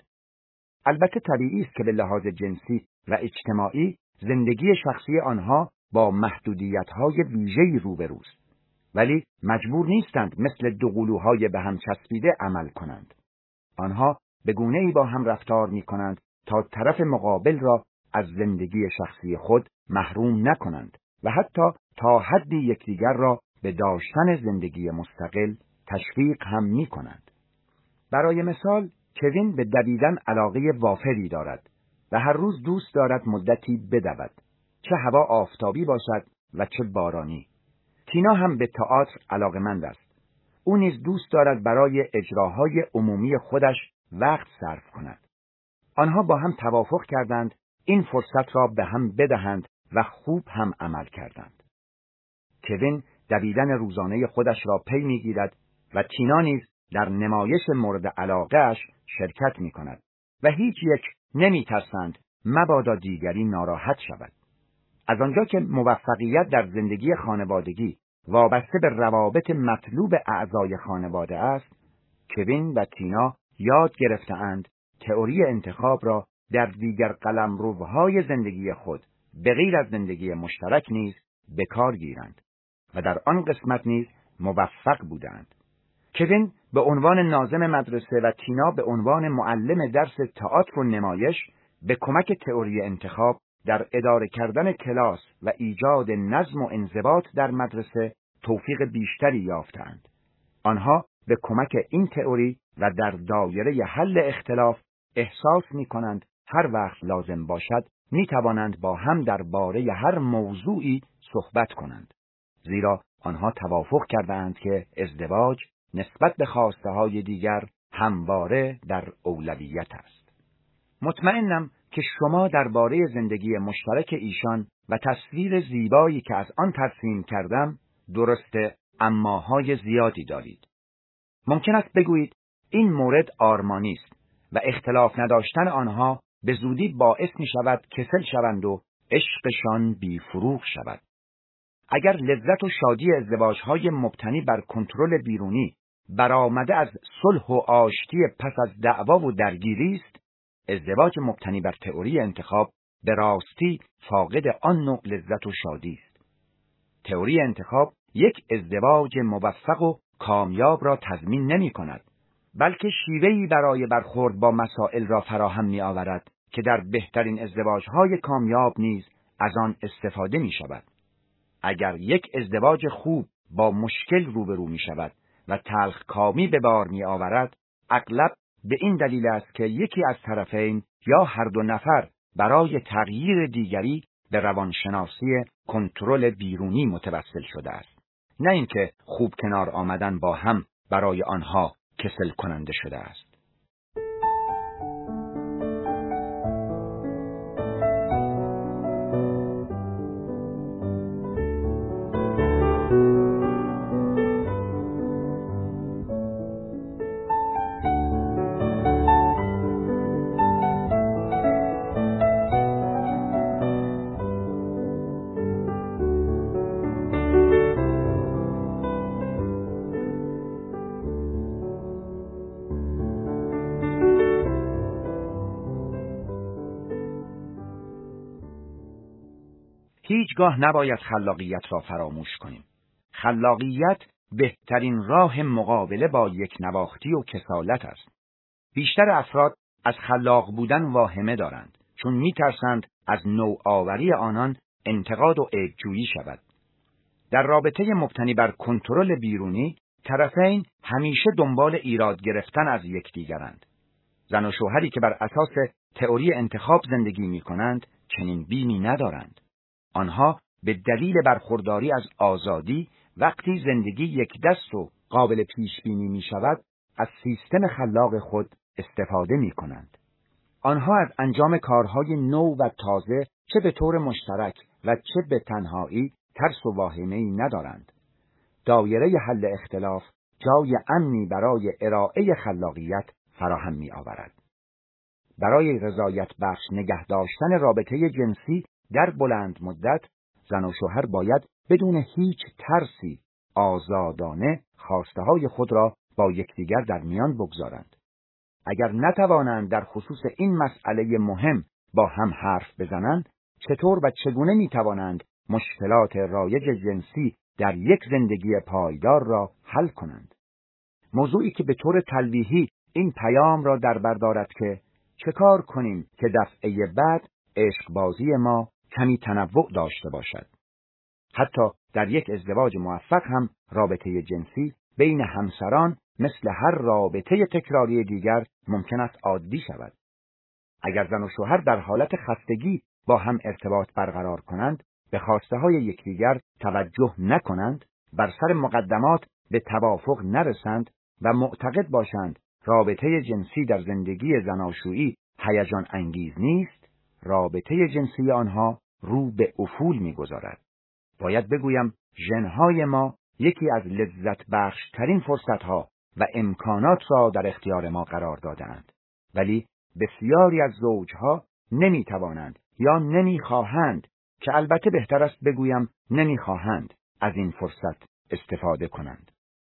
البته طبیعی است که به لحاظ جنسی و اجتماعی زندگی شخصی آنها با محدودیت‌های ویژه‌ای روبروست، ولی مجبور نیستند مثل دو قلوهای به هم چسبیده عمل کنند. آنها به گونه‌ای با هم رفتار می‌کنند تا طرف مقابل را از زندگی شخصی خود محروم نکنند و حتی تا حدی یکدیگر را به داشتن زندگی مستقل تشویق هم می‌کنند. برای مثال، کوین به دویدن علاقه وافری دارد و هر روز دوست دارد مدتی بدود، چه هوا آفتابی باشد و چه بارانی. تینا هم به تئاتر علاقه‌مند است. او نیز دوست دارد برای اجراهای عمومی خودش وقت صرف کند. آنها با هم توافق کردند این فرصت را به هم بدهند و خوب هم عمل کردند. کوین دویدن روزانه خودش را پی می‌گیرد و تینا نیز در نمایش مورد علاقه‌اش شرکت می‌کند و هیچ یک نمی‌ترسند مبادا دیگری ناراحت شود. از آنجا که موفقیت در زندگی خانوادگی وابسته به روابط مطلوب اعضای خانواده است، کوین و تینا یاد گرفته‌اند تئوری انتخاب را در دیگر قلمروهای زندگی خود به غیر از زندگی مشترک نیز به کار گیرند و در آن قسمت نیز موفق بودند. کوین به عنوان ناظم مدرسه و تینا به عنوان معلم درس تئاتر و نمایش به کمک تئوری انتخاب در اداره کردن کلاس و ایجاد نظم و انضباط در مدرسه توفیق بیشتری یافتند. آنها به کمک این تئوری و در دایره حل اختلاف احساس می کنند هر وقت لازم باشد می توانند با هم درباره هر موضوعی صحبت کنند، زیرا آنها توافق کردند که ازدواج نسبت به خواسته های دیگر همواره در اولویت است. مطمئنم که شما درباره زندگی مشترک ایشان و تصویر زیبایی که از آن ترسیم کردم درسته اماهای زیادی دارید. ممکن است بگویید این مورد آرمانی است و اختلاف نداشتن آنها به زودی باعث می شود کسل شوند و عشقشان بیفروغ شود. اگر لذت و شادی ازدواج‌های مبتنی بر کنترل بیرونی برآمده از صلح و آشتی پس از دعوا و درگیری است، ازدواج مبتنی بر تئوری انتخاب به راستی فاقد آن نوع لذت و شادی است. تئوری انتخاب یک ازدواج موفق و کامیاب را تضمین نمی کند، بلکه شیوهی برای برخورد با مسائل را فراهم می آورد که در بهترین ازدواج‌های کامیاب نیز از آن استفاده می شود. اگر یک ازدواج خوب با مشکل روبرو می شود و تلخکامی به بار می آورد، اغلب به این دلیل است که یکی از طرفین یا هر دو نفر برای تغییر دیگری به روانشناسی کنترل بیرونی متوسل شده است، نه اینکه خوب کنار آمدن با هم برای آنها کسل کننده شده است. هیچگاه نباید خلاقیت را فراموش کنیم. خلاقیت بهترین راه مقابله با یک نواختی و کسالت است. بیشتر افراد از خلاق بودن واهمه دارند، چون می‌ترسند از نوآوری آنان انتقاد و عیب‌جویی شود. در رابطه مبتنی بر کنترل بیرونی، طرفین همیشه دنبال ایراد گرفتن از یکدیگرند. زن و شوهری که بر اساس تئوری انتخاب زندگی می‌کنند، چنین بیمی ندارند. آنها به دلیل برخورداری از آزادی، وقتی زندگی یک دست و قابل پیش بینی می شود، از سیستم خلاق خود استفاده می کنند. آنها از انجام کارهای نو و تازه چه به طور مشترک و چه به تنهایی ترس و واهمه‌ای ندارند. دایره حل اختلاف جای امنی برای ارائه خلاقیت فراهم می آورد. برای رضایت بخش نگه داشتن رابطه جنسی در بلند مدت، زن و شوهر باید بدون هیچ ترسی آزادانه خواسته های خود را با یکدیگر در میان بگذارند. اگر نتوانند در خصوص این مسئله مهم با هم حرف بزنند، چطور و چگونه میتوانند مشکلات رایج جنسی در یک زندگی پایدار را حل کنند؟ موضوعی که به طور تلویحی این پیام را در بر دارد که چه کار کنیم که دفعه بعد عشقبازی ما کمی تنوع داشته باشد. حتی در یک ازدواج موفق هم رابطه جنسی بین همسران مثل هر رابطه تکراری دیگر ممکن است عادی شود. اگر زن و شوهر در حالت خستگی با هم ارتباط برقرار کنند، به خواسته های یکدیگر توجه نکنند، بر سر مقدمات به توافق نرسند و معتقد باشند رابطه جنسی در زندگی زناشویی هیجان انگیز نیست، رابطه جنسی آنها رو به افول می‌گذارد. باید بگویم ژن‌های ما یکی از لذت بخش‌ترین فرصت‌ها و امکانات را در اختیار ما قرار داده‌اند، ولی بسیاری از زوجها نمی‌توانند یا نمی‌خواهند، که البته بهتر است بگویم نمی‌خواهند، از این فرصت استفاده کنند.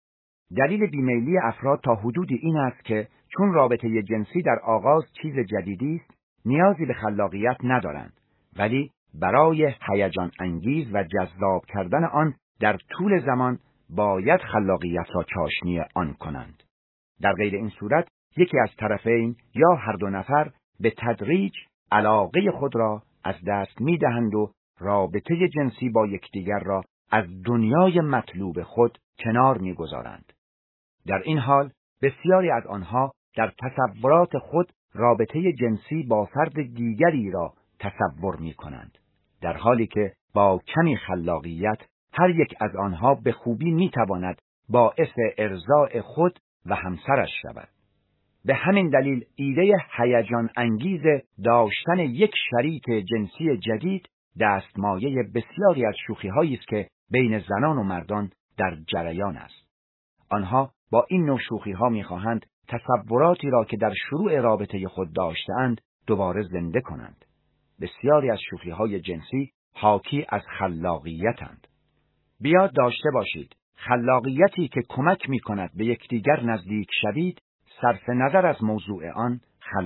دلیل بیمیلی افراد تا حدودی این است که چون رابطه جنسی در آغاز چیز جدیدی است، نیازی به خلاقیت ندارند، ولی برای هیجان انگیز و جذاب کردن آن در طول زمان باید خلاقیت را چاشنی آن کنند. در غیر این صورت یکی از طرفین یا هر دو نفر به تدریج علاقه خود را از دست می‌دهند و رابطه جنسی با یکدیگر را از دنیای مطلوب خود کنار می‌گذارند. در این حال بسیاری از آنها در تصورات خود رابطه جنسی با فرد دیگری را تصور می‌کنند، در حالی که با کمی خلاقیت هر یک از آنها به خوبی می‌تواند باعث ارضاء خود و همسرش شود. به همین دلیل ایده هیجان انگیز داشتن یک شریک جنسی جدید دستمایه بسیاری از شوخی‌هایی است که بین زنان و مردان در جریان است. آنها با این نوع شوخی‌ها می‌خواهند تصوراتی را که در شروع رابطه خود داشته‌اند دوباره زنده کنند. بسیاری از شوخی‌های جنسی حاکی از خلاقیت‌اند. بیاد داشته باشید خلاقیتی که کمک می‌کند به یکدیگر نزدیک شوید، صرف نظر از موضوع آن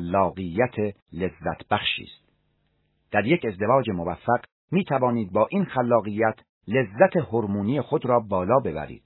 خلاقیت لذت بخشی است. در یک ازدواج موفق می‌توانید با این خلاقیت لذت هورمونی خود را بالا ببرید.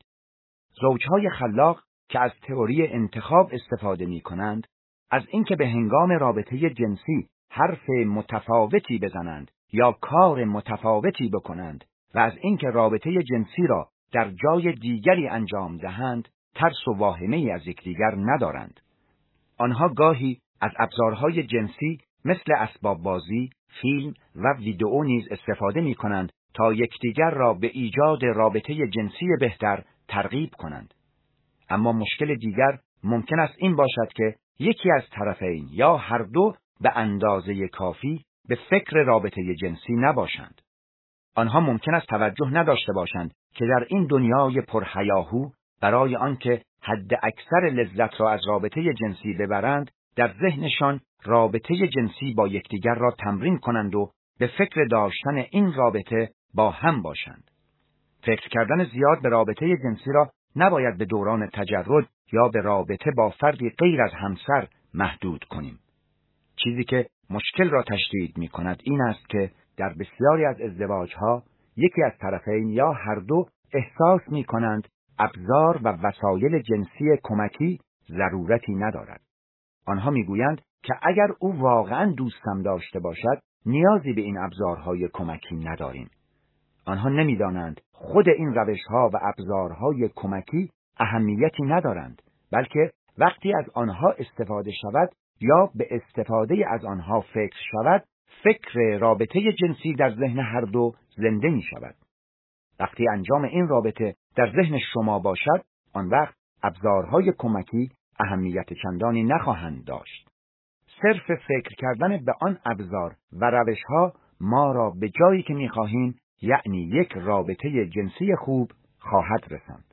زوجهای خلاق که از تئوری انتخاب استفاده می‌کنند، از اینکه به هنگام رابطه جنسی حرف متفاوتی بزنند یا کار متفاوتی بکنند و از اینکه رابطه جنسی را در جای دیگری انجام دهند، ترس و واهمه‌ای از یکدیگر ندارند. آنها گاهی از ابزارهای جنسی مثل اسباب بازی، فیلم و ویدئو نیز استفاده می‌کنند تا یکدیگر را به ایجاد رابطه جنسی بهتر ترغیب کنند. اما مشکل دیگر ممکن است این باشد که یکی از طرفین یا هر دو به اندازه کافی به فکر رابطه جنسی نباشند. آنها ممکن است توجه نداشته باشند که در این دنیای پرهیاهو برای آنکه حد اکثر لذت را از رابطه جنسی ببرند، در ذهنشان رابطه جنسی با یکدیگر را تمرین کنند و به فکر داشتن این رابطه با هم باشند. فکر کردن زیاد به رابطه جنسی را نباید به دوران تجرد یا به رابطه با فردی غیر از همسر محدود کنیم. چیزی که مشکل را تشدید می کند این است که در بسیاری از ازدواجها یکی از طرفین یا هر دو احساس می‌کنند ابزار و وسایل جنسی کمکی ضرورتی ندارد. آنها می‌گویند که اگر او واقعاً دوستم داشته باشد، نیازی به این ابزارهای کمکی نداریم. آنها نمی‌دانند خود این روش‌ها و ابزارهای کمکی اهمیتی ندارند، بلکه وقتی از آنها استفاده شود یا به استفاده از آنها فکر شود، فکر رابطه جنسی در ذهن هر دو زنده می‌شود. وقتی انجام این رابطه در ذهن شما باشد، آن وقت ابزارهای کمکی اهمیت چندانی نخواهند داشت. صرف فکر کردن به آن ابزار و روش‌ها ما را به جایی که می‌خواهیم، یعنی یک رابطه جنسی خوب، خواهد رساند.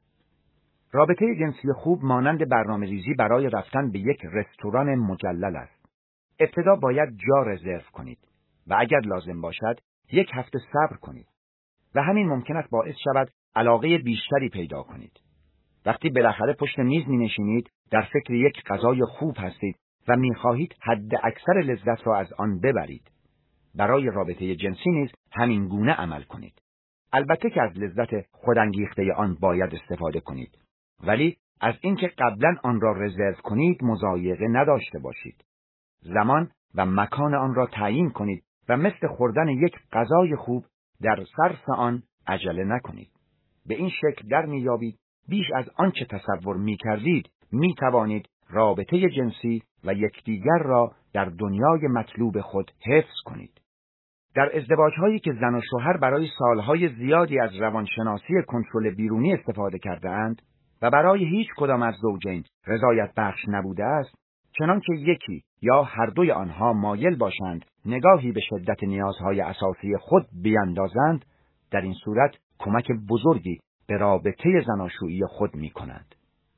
رابطه جنسی خوب مانند برنامه‌ریزی برای رفتن به یک رستوران مجلل است. ابتدا باید جا رزرو کنید و اگر لازم باشد یک هفته صبر کنید و همین ممکن است باعث شود علاقه بیشتری پیدا کنید. وقتی بالاخره پشت میز می‌نشینید، در فکر یک غذای خوب هستید و می‌خواهید حد اکثر لذت را از آن ببرید. برای رابطه جنسی نیز همین گونه عمل کنید. البته که از لذت خودانگیخته آن باید استفاده کنید، ولی از اینکه قبلا آن را رزرو کنید مضایقه نداشته باشید. زمان و مکان آن را تعیین کنید و مثل خوردن یک غذای خوب در صرف آن عجله نکنید. به این شکل در میابید بیش از آنچه تصور میکردید میتوانید رابطه جنسی و یکدیگر را در دنیای مطلوب خود حفظ کنید. در ازدواج‌هایی که زن و شوهر برای سالهای زیادی از روانشناسی کنترل بیرونی استفاده کرده اند و برای هیچ کدام از زوجین رضایت بخش نبوده است، چنانکه یکی یا هر دوی آنها مایل باشند نگاهی به شدت نیازهای اساسی خود بیندازند، در این صورت کمک بزرگی به رابطه زناشویی خود می کنند.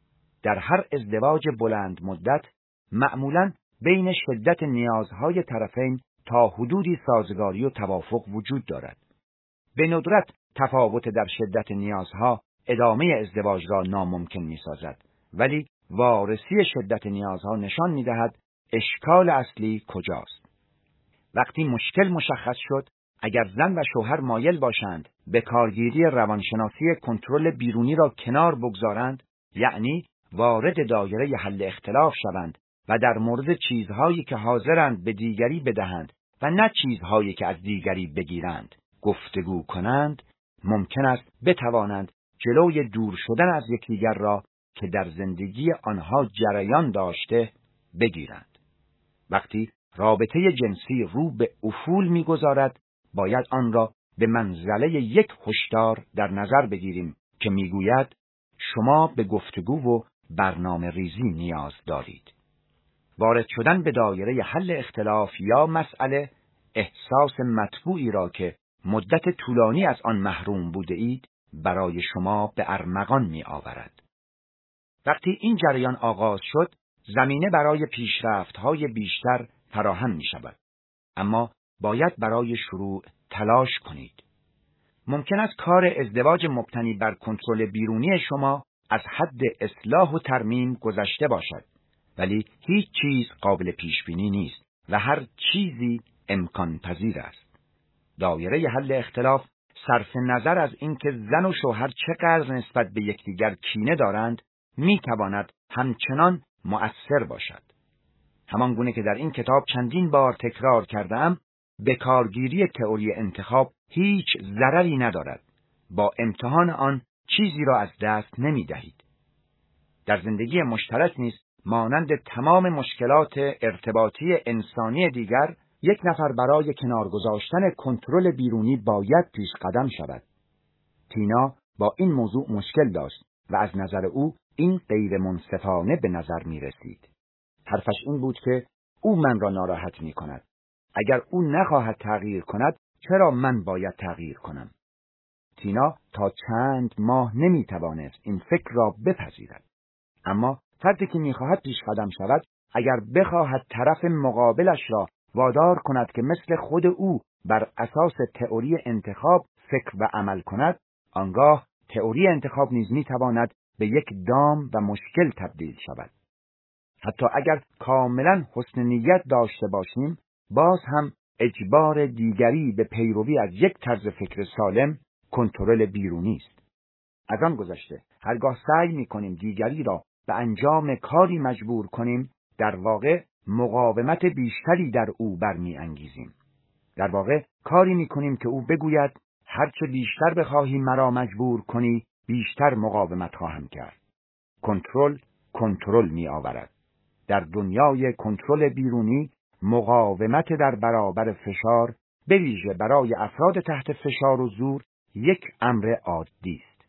در هر ازدواج بلند مدت معمولاً بین شدت نیازهای طرفین تا حدودی سازگاری و توافق وجود دارد. به ندرت تفاوت در شدت نیازها ادامه ازدواج را ناممکن می سازد، ولی وارسی شدت نیازها نشان می دهد اشکال اصلی کجاست. وقتی مشکل مشخص شد، اگر زن و شوهر مایل باشند به کارگیری روانشناسی کنترل بیرونی را کنار بگذارند، یعنی وارد دایره حل اختلاف شوند و در مورد چیزهایی که حاضرند به دیگری بدهند و نه چیزهایی که از دیگری بگیرند گفتگو کنند، ممکن است بتوانند جلوی دور شدن از یکدیگر را که در زندگی آنها جریان داشته بگیرند. وقتی رابطه جنسی رو به افول می‌گذارد، باید آن را به منزله یک هشدار در نظر بگیریم که می‌گوید شما به گفتگو و برنامه ریزی نیاز دارید. وارد شدن به دایره حل اختلاف یا مسئله احساس مطبوعی را که مدت طولانی از آن محروم بوده اید برای شما به ارمغان می آورد. وقتی این جریان آغاز شد، زمینه برای پیشرفت‌های بیشتر فراهم می شود. اما باید برای شروع تلاش کنید. ممکن است کار ازدواج مبتنی بر کنترل بیرونی شما از حد اصلاح و ترمیم گذشته باشد، ولی هیچ چیز قابل پیش بینی نیست و هر چیزی امکان پذیر است. دایره حل اختلاف صرف نظر از اینکه زن و شوهر چقدر نسبت به یکدیگر کینه دارند، میتواند همچنان مؤثر باشد. همان گونه که در این کتاب چندین بار تکرار کردم، به کارگیری تئوری انتخاب هیچ ضرری ندارد. با امتحان آن چیزی را از دست نمی دهید. در زندگی مشترک نیز مانند تمام مشکلات ارتباطی انسانی دیگر، یک نفر برای کنار گذاشتن کنترل بیرونی باید پیش قدم شود. تینا با این موضوع مشکل داشت و از نظر او این غیر منصفانه به نظر می رسید. حرفش این بود که او من را ناراحت می کند. اگر او نخواهد تغییر کند، چرا من باید تغییر کنم؟ تینا تا چند ماه نمی توانست این فکر را بپذیرد. اما فردی که می خواهد پیش قدم شود، اگر بخواهد طرف مقابلش را وادار کند که مثل خود او بر اساس تئوری انتخاب فکر و عمل کند، آنگاه تئوری انتخاب نیز می تواند به یک دام و مشکل تبدیل شود. حتی اگر کاملا حسن نیت داشته باشیم، باز هم اجبار دیگری به پیروی از یک طرز فکر سالم کنترل بیرونی است. از آن گذشته هرگاه سعی می‌کنیم دیگری را به انجام کاری مجبور کنیم، در واقع مقاومت بیشتری در او برمی‌انگیزیم. در واقع کاری می‌کنیم که او بگوید هرچه بیشتر بخواهی مرا مجبور کنی، بیشتر مقاومت خواهم کرد. کنترل کنترل می‌آورد. در دنیای کنترل بیرونی، مقاومت در برابر فشار، به ویژه برای افراد تحت فشار و زور، یک امر عادی است.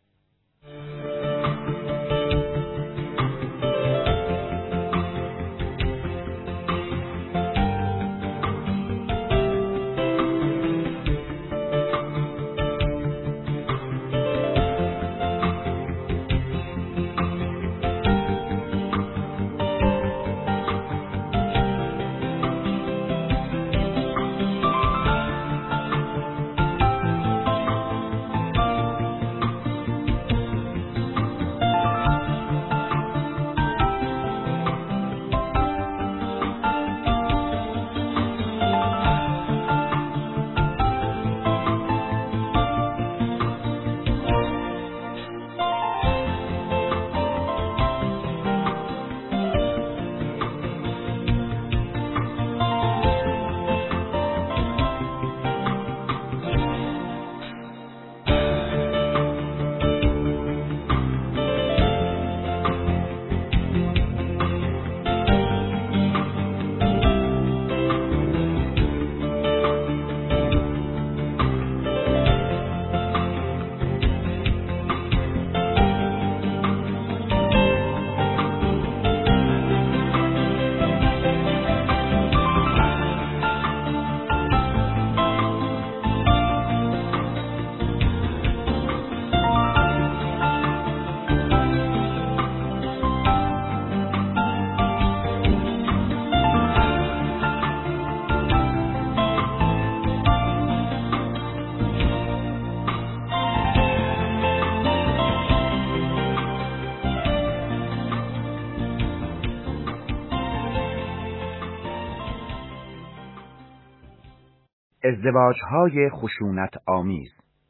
ازدواج‌های خشونت آمیز.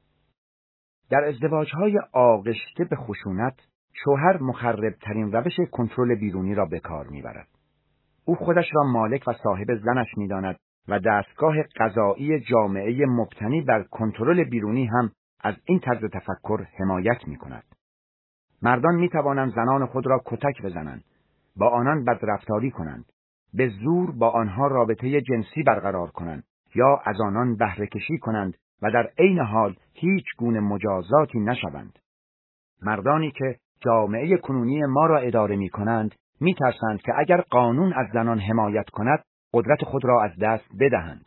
در ازدواج‌های آغشته به خشونت، شوهر مخرب‌ترین روش کنترل بیرونی را به کار می‌برد. او خودش را مالک و صاحب زنش می‌داند و دستگاه قضایی جامعه مبتنی بر کنترل بیرونی هم از این طرز تفکر حمایت می‌کند. مردان می‌توانند زنان خود را کتک بزنند، با آنان بدرفتاری کنند، به زور با آنها رابطه جنسی برقرار کنند یا از آنان بهره کشی کنند و در عین حال هیچ گونه مجازاتی نشوند. مردانی که جامعه کنونی ما را اداره می کنند می ترسند که اگر قانون از زنان حمایت کند قدرت خود را از دست بدهند.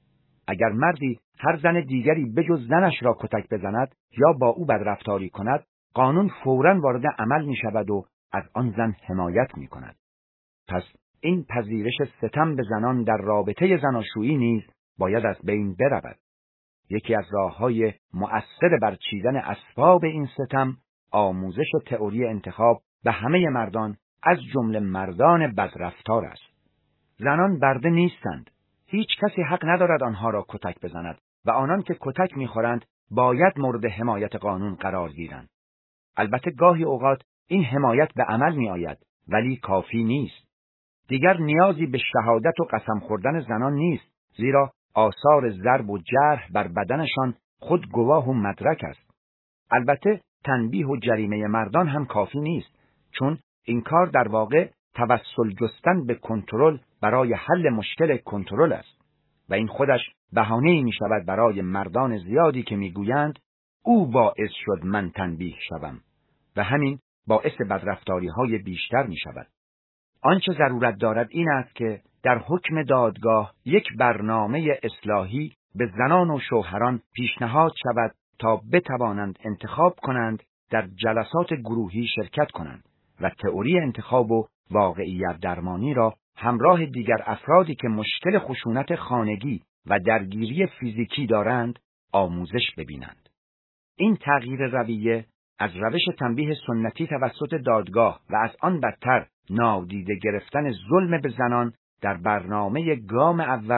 اگر مردی هر زن دیگری بجز زنش را کتک بزند یا با او بدرفتاری کند، قانون فوراً وارد عمل می شود و از آن زن حمایت می کند. پس این پذیرش ستم به زنان در رابطه زناشویی نیز باید از بین برود. یکی از راه‌های مؤثر بر چیدن اسباب این ستم، آموزش تئوری انتخاب به همه مردان از جمله مردان بدرفتار است. زنان برده نیستند. هیچ کسی حق ندارد آنها را کتک بزند و آنان که کتک می‌خورند باید مورد حمایت قانون قرار گیرند. البته گاهی اوقات این حمایت به عمل می‌آید، ولی کافی نیست. دیگر نیازی به شهادت و قسم خوردن زنان نیست، زیرا آثار ضرب و جرح بر بدنشان خود گواه و مدرک است. البته تنبیه و جریمه مردان هم کافی نیست، چون این کار در واقع توسل جستن به کنترل برای حل مشکل کنترل است و این خودش بهانه‌ای می شود برای مردان زیادی که می گویند او باعث شد من تنبیه شوم و همین باعث بدرفتاری های بیشتر می شود. آنچه ضرورت دارد این است که در حکم دادگاه یک برنامه اصلاحی به زنان و شوهران پیشنهاد شود تا بتوانند انتخاب کنند، در جلسات گروهی شرکت کنند و تئوری انتخاب و واقعیت درمانی را همراه دیگر افرادی که مشکل خشونت خانگی و درگیری فیزیکی دارند آموزش ببینند. این تغییر رویه از روش تنبیه سنتی توسط دادگاه و از آن بدتر نادیده گرفتن ظلم به زنان در برنامه گام اول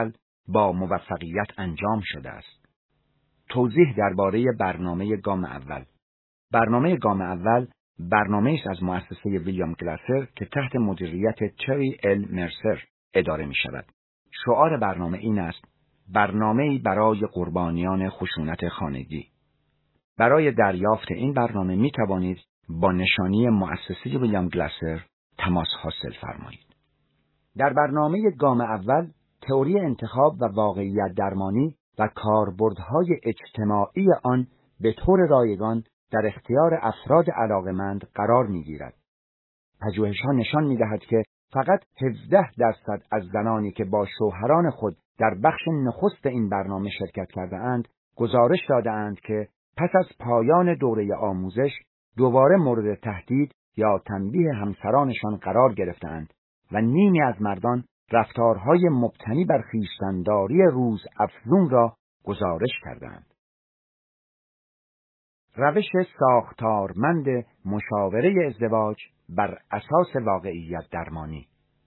با موفقیت انجام شده است. توضیح درباره برنامه گام اول. برنامه گام اول برنامه است از مؤسسه ویلیام گلاسر که تحت مدیریت تری ال مرسر اداره می شود. شعار برنامه این است: برنامه‌ای برای قربانیان خشونت خانگی. برای دریافت این برنامه می توانید با نشانی مؤسسه ویلیام گلاسر تماس حاصل فرمایید. در برنامه گام اول، تئوری انتخاب و واقعیت درمانی و کاربردهای اجتماعی آن به طور رایگان در اختیار افراد علاقمند قرار می‌گیرد. پژوهش‌ها نشان می‌دهد که فقط هفده درصد از زنانی که با شوهران خود در بخش نخست این برنامه شرکت کرده‌اند، گزارش داده‌اند که پس از پایان دوره آموزش دوباره مورد تهدید یا تنبیه همسرانشان قرار گرفته‌اند و نیمی از مردان رفتارهای مبتنی بر خویشتن‌داری روز افزون را گزارش کردند. روش ساختارمند مشاوره ازدواج بر اساس واقعیت درمانی.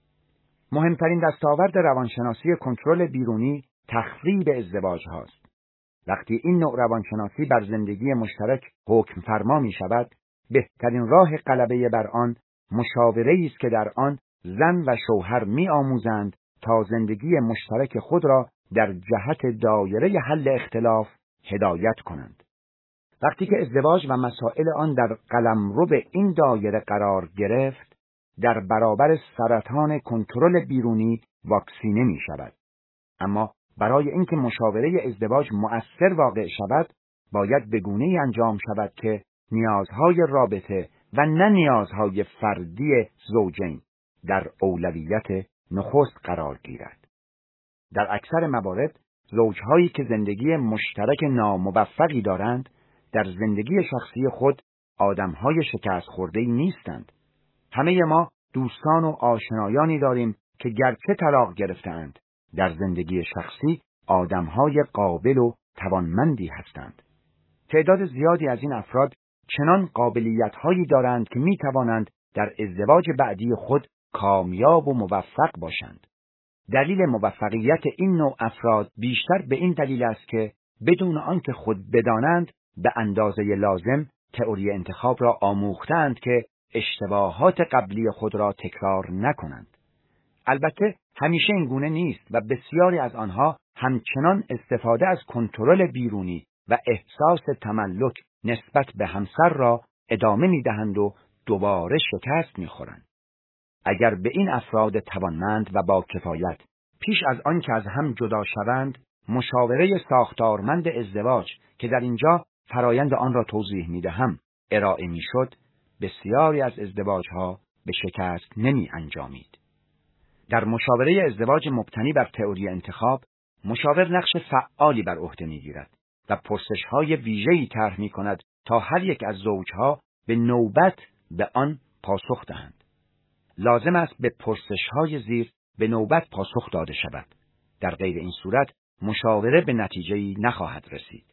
مهمترین دستاورد روانشناسی کنترل بیرونی تخریب ازدواج هاست. وقتی این نوع روانشناسی بر زندگی مشترک حکم فرما می شود، بهترین راه غلبه بر آن مشاوره‌ای است که در آن زن و شوهر می آموزند تا زندگی مشترک خود را در جهت دایره حل اختلاف هدایت کنند. وقتی که ازدواج و مسائل آن در قلمرو این دایره قرار گرفت، در برابر سرطان کنترل بیرونی واکسینه می شود. اما برای اینکه مشاوره ازدواج مؤثر واقع شود، باید به گونه‌ای انجام شود که نیازهای رابطه و نه نیازهای فردی زوجین در اولویت نخست قرار گیرد. در اکثر موارد، زوجهایی که زندگی مشترک ناموفقی دارند، در زندگی شخصی خود آدمهای شکست خورده‌ای نیستند. همه ما دوستان و آشنایانی داریم که گرچه طلاق گرفته‌اند، در زندگی شخصی آدمهای قابل و توانمندی هستند. تعداد زیادی از این افراد چنان قابلیت‌هایی دارند که می‌توانند در ازدواج بعدی خود کامیاب و موفق باشند. دلیل موفقیت این نوع افراد بیشتر به این دلیل است که بدون آنکه خود بدانند به اندازه لازم تئوری انتخاب را آموختند که اشتباهات قبلی خود را تکرار نکنند. البته همیشه این گونه نیست و بسیاری از آنها همچنان استفاده از کنترل بیرونی و احساس تملک نسبت به همسر را ادامه می‌دهند و دوباره شکست می‌خورند. اگر به این افراد توانمند و با کفایت پیش از آن که از هم جدا شوند، مشاوره ساختارمند ازدواج که در اینجا فرایند آن را توضیح می‌دهم ارائه می‌شد، بسیاری از ازدواج‌ها به شکست نمی انجامید. در مشاوره ازدواج مبتنی بر تئوری انتخاب، مشاور نقش فعالی بر عهده می‌گیرد و پرسش‌های ویژه‌ای طرح می‌کند تا هر یک از زوجها به نوبت به آن پاسخ دهند. لازم است به پرسش‌های زیر به نوبت پاسخ داده شود. در غیر این صورت مشاوره به نتیجه‌ای نخواهد رسید.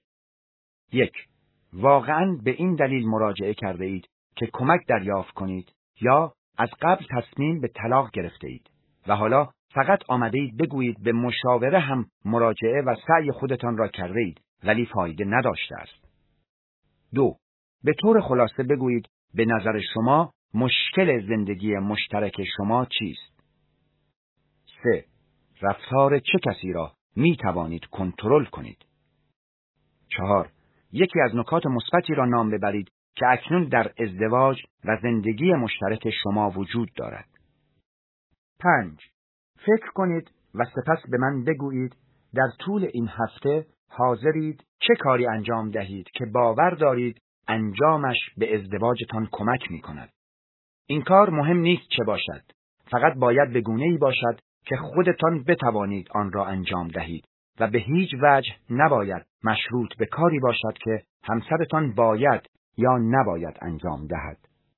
یک. واقعاً به این دلیل مراجعه کرده اید که کمک دریافت کنید یا از قبل تصمیم به طلاق گرفته اید و حالا فقط آمده اید بگویید به مشاوره هم مراجعه و سعی خودتان را کرده اید ولی فایده نداشته است. دو. به طور خلاصه بگویید به نظر شما مشکل زندگی مشترک شما چیست؟ سه. رفتار چه کسی را می توانید کنترل کنید؟ چهار. یکی از نکات مثبتی را نام ببرید که اکنون در ازدواج و زندگی مشترک شما وجود دارد. پنج. فکر کنید و سپس به من بگویید در طول این هفته حاضرید چه کاری انجام دهید که باور دارید انجامش به ازدواجتان کمک می کند. این کار مهم نیست چه باشد، فقط باید به گونه‌ای باشد که خودتان بتوانید آن را انجام دهید و به هیچ وجه نباید مشروط به کاری باشد که همسرتان باید یا نباید انجام دهد.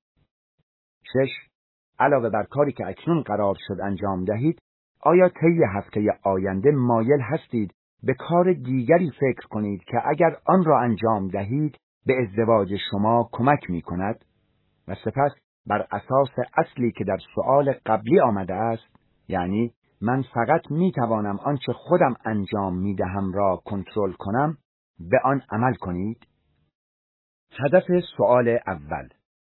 شش. علاوه بر کاری که اکنون قرار شد انجام دهید، آیا طی هفته آینده مایل هستید به کار دیگری فکر کنید که اگر آن را انجام دهید به ازدواج شما کمک می کند؟ و سپس بر اساس اصلی که در سؤال قبلی آمده است، یعنی من فقط می توانم آنچه خودم انجام می دهم را کنترل کنم، به آن عمل کنید؟ هدف سؤال اول.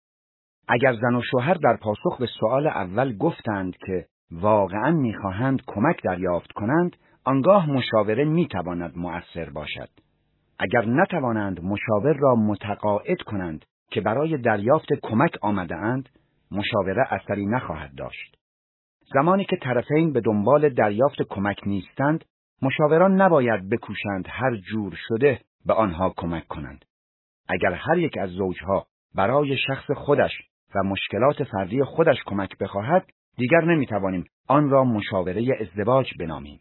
اگر زن و شوهر در پاسخ به سؤال اول گفتند که واقعاً می‌خواهند کمک دریافت کنند، آنگاه مشاوره می‌تواند مؤثر باشد. اگر نتوانند مشاور را متقاعد کنند که برای دریافت کمک آمده‌اند، مشاوره اثری نخواهد داشت. زمانی که طرفین به دنبال دریافت کمک نیستند، مشاوران نباید بکوشند هر جور شده به آنها کمک کنند. اگر هر یک از زوجها برای شخص خودش و مشکلات فردی خودش کمک بخواهد، دیگر نمیتوانیم آن را مشاوره ازدواج بنامیم.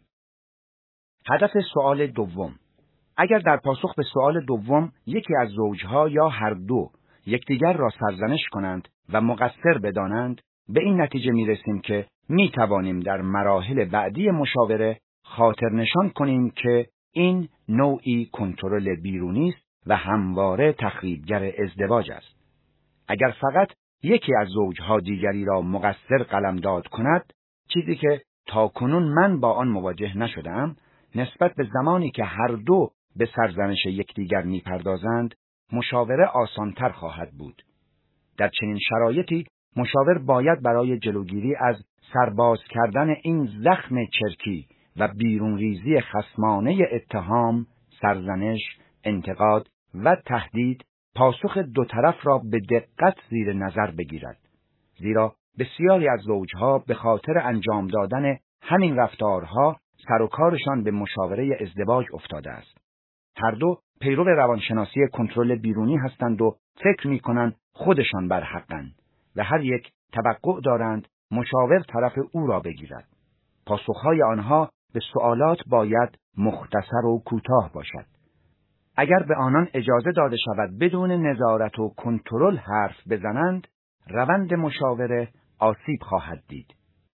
هدف سؤال دوم. اگر در پاسخ به سؤال دوم یکی از زوجها یا هر دو یکدیگر را سرزنش کنند و مقصر بدانند، به این نتیجه میرسیم که میتوانیم در مراحل بعدی مشاوره خاطر نشان کنیم که این نوعی کنترل بیرونی است و همواره تخریبگر ازدواج است. اگر فقط یکی از زوجها دیگری را مقصر قلمداد کند، چیزی که تاکنون من با آن مواجه نشدم، نسبت به زمانی که هر دو به سرزنش یکدیگر میپردازند، مشاوره آسانتر خواهد بود. در چنین شرایطی مشاور باید برای جلوگیری از سرباز کردن این زخم چرکی و بیرون ریزی خصمانه اتهام، سرزنش، انتقاد و تهدید، پاسخ دو طرف را به دقت زیر نظر بگیرد. زیرا بسیاری از زوجها به خاطر انجام دادن همین رفتارها سر و کارشان به مشاوره ازدواج افتاده است. هر دو پیرو روانشناسی کنترل بیرونی هستند و فکر می‌کنند خودشان بر حقند و هر یک توقع دارند مشاور طرف او را بگیرد. پاسخهای آنها به سوالات باید مختصر و کوتاه باشد. اگر به آنان اجازه داده شود بدون نظارت و کنترل حرف بزنند، روند مشاوره آسیب خواهد دید.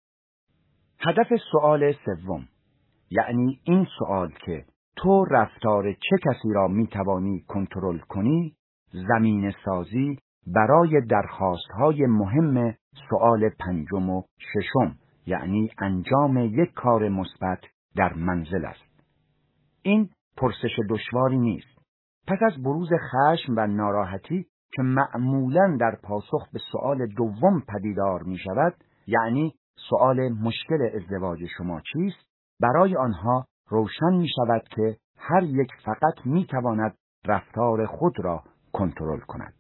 هدف سؤال سوم، یعنی این سؤال که تو رفتار چه کسی را میتوانی کنترل کنی، زمینه سازی برای درخواست‌های مهم سؤال پنجم و ششم، یعنی انجام یک کار مثبت در منزل است. این پرسش دشواری نیست. پس از بروز خشم و ناراحتی که معمولاً در پاسخ به سؤال دوم پدیدار می شود، یعنی سؤال مشکل ازدواج شما چیست، برای آنها روشن می شود که هر یک فقط می تواند رفتار خود را کنترل کند.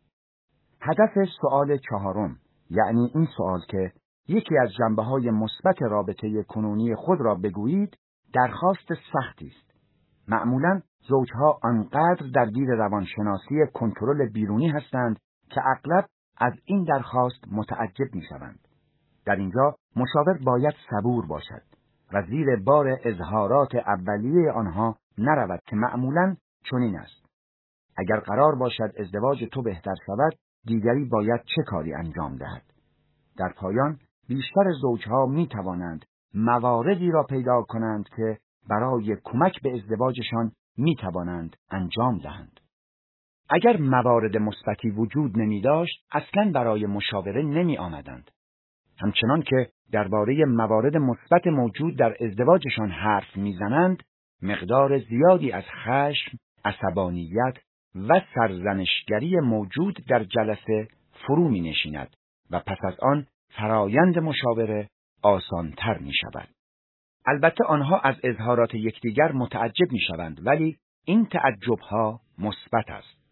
هدف سؤال چهارم، یعنی این سؤال که یکی از جنبه‌های مثبت رابطه کنونی خود را بگویید، درخواست سختی است. معمولاً زوجها آنقدر درگیر روانشناسی کنترل بیرونی هستند که اغلب از این درخواست متعجب می‌شوند. در اینجا مشاور باید صبور باشد و زیر بار اظهارات اولیه آنها نرود که معمولاً چنین است: اگر قرار باشد ازدواج تو بهتر شود، دیگری باید چه کاری انجام دهد؟ در پایان بیشتر زوجها می توانند مواردی را پیدا کنند که برای کمک به ازدواجشان می توانند انجام دهند. اگر موارد مثبتی وجود نمی داشت، اصلاً برای مشاوره نمی آمدند. همچنان که درباره موارد مثبت موجود در ازدواجشان حرف می زنند، مقدار زیادی از خشم، عصبانیت و سرزنشگری موجود در جلسه فرو می نشیند و پس از آن فرایند مشاوره آسانتر می شود. البته آنها از اظهارات یکدیگر متعجب می شوند، ولی این تعجبها مثبت است.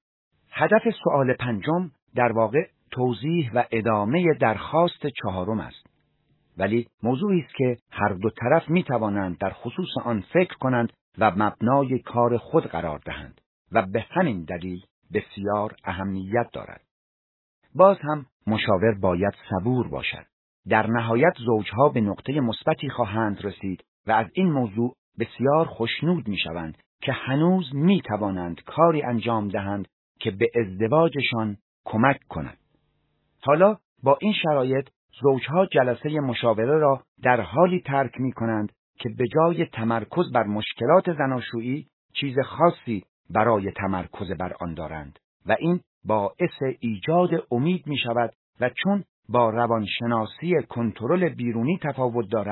هدف سؤال پنجم در واقع توضیح و ادامه درخواست چهارم است. ولی موضوعی است که هر دو طرف می توانند در خصوص آن فکر کنند و مبنای کار خود قرار دهند و به همین دلیل بسیار اهمیت دارد. باز هم مشاور باید صبور باشد. در نهایت زوجها به نقطه مثبتی خواهند رسید و از این موضوع بسیار خوشنود می شوند که هنوز می توانند کاری انجام دهند که به ازدواجشان کمک کند. حالا با این شرایط زوجها جلسه مشاوره را در حالی ترک می کنند که به جای تمرکز بر مشکلات زناشویی چیز خاصی برای تمرکز بر آن دارند و این باعث ایجاد امید می شود و چون با روانشناسی کنترل بیرونی تفاوت دارد،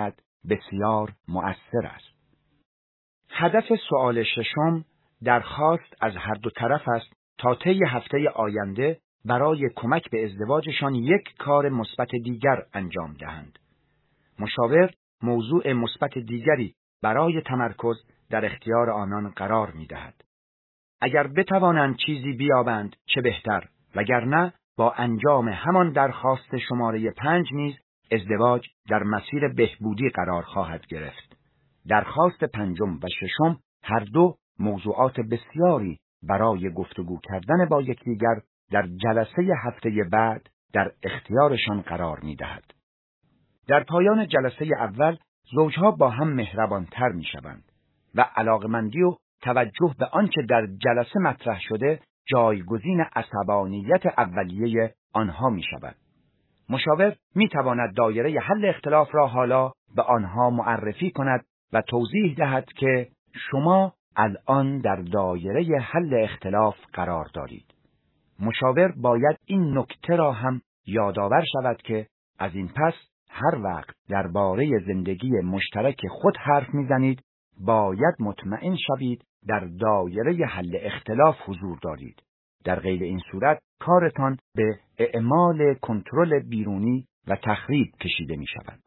بسیار مؤثر است. هدف سؤال ششم درخواست از هر دو طرف است تا طی هفته آینده برای کمک به ازدواجشان یک کار مثبت دیگر انجام دهند. مشاور موضوع مثبت دیگری برای تمرکز در اختیار آنان قرار می‌دهد. اگر بتوانند چیزی بیابند چه بهتر، وگرنه با انجام همان درخواست شماره پنج نیز ازدواج در مسیر بهبودی قرار خواهد گرفت. درخواست پنجم و ششم هر دو موضوعات بسیاری برای گفتگو کردن با یکدیگر در جلسه هفته بعد در اختیارشان قرار می‌دهد. در پایان جلسه اول زوجها با هم مهربانتر می‌شوند و علاقمندی و توجه به آنچه در جلسه مطرح شده جایگزین عصبانیت اولیه آنها می‌شود. مشاور می‌تواند دایره حل اختلاف را حالا به آنها معرفی کند و توضیح دهد که شما الان در دایره حل اختلاف قرار دارید. مشاور باید این نکته را هم یادآور شود که از این پس هر وقت درباره زندگی مشترک خود حرف می‌زنید باید مطمئن شوید در دایره حل اختلاف حضور دارید. در غیر این صورت کارتان به اعمال کنترل بیرونی و تخریب کشیده می‌شود.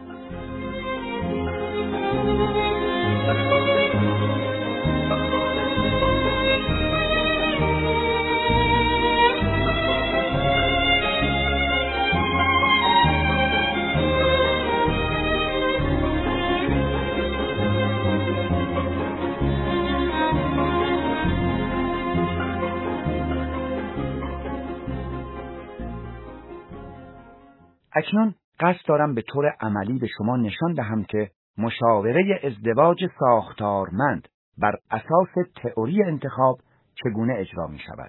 اکنون قصد دارم به طور عملی به شما نشان دهم که مشاوره ازدواج ساختارمند بر اساس تئوری انتخاب چگونه اجرا می شود.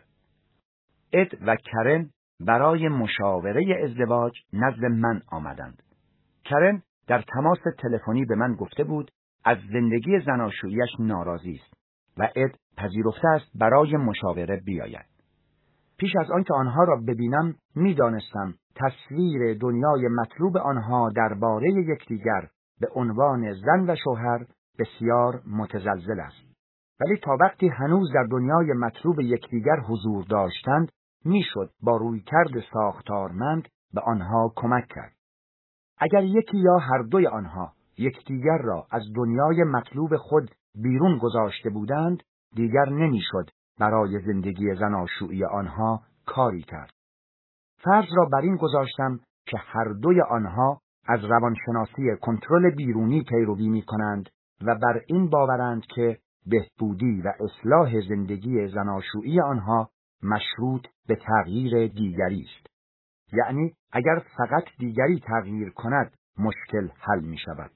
اد و کرن برای مشاوره ازدواج نزد من آمدند. کرن در تماس تلفنی به من گفته بود از زندگی زناشویی‌اش ناراضی است و اد پذیرفته است برای مشاوره بیاید. پیش از آنکه آنها را ببینم می‌دانستم تصویر دنیای مطلوب آنها درباره یکدیگر به عنوان زن و شوهر بسیار متزلزل است. ولی تا وقتی هنوز در دنیای مطلوب یکدیگر حضور داشتند میشد با رویکرد ساختارمند به آنها کمک کرد. اگر یکی یا هر دوی آنها یکدیگر را از دنیای مطلوب خود بیرون گذاشته بودند دیگر نمیشد برای زندگی زناشویی آنها کاری کرد. فرض را بر این گذاشتم که هر دوی آنها از روانشناسی کنترل بیرونی پیروی می کنند و بر این باورند که بهبودی و اصلاح زندگی زناشویی آنها مشروط به تغییر دیگری است. یعنی اگر فقط دیگری تغییر کند مشکل حل می شود.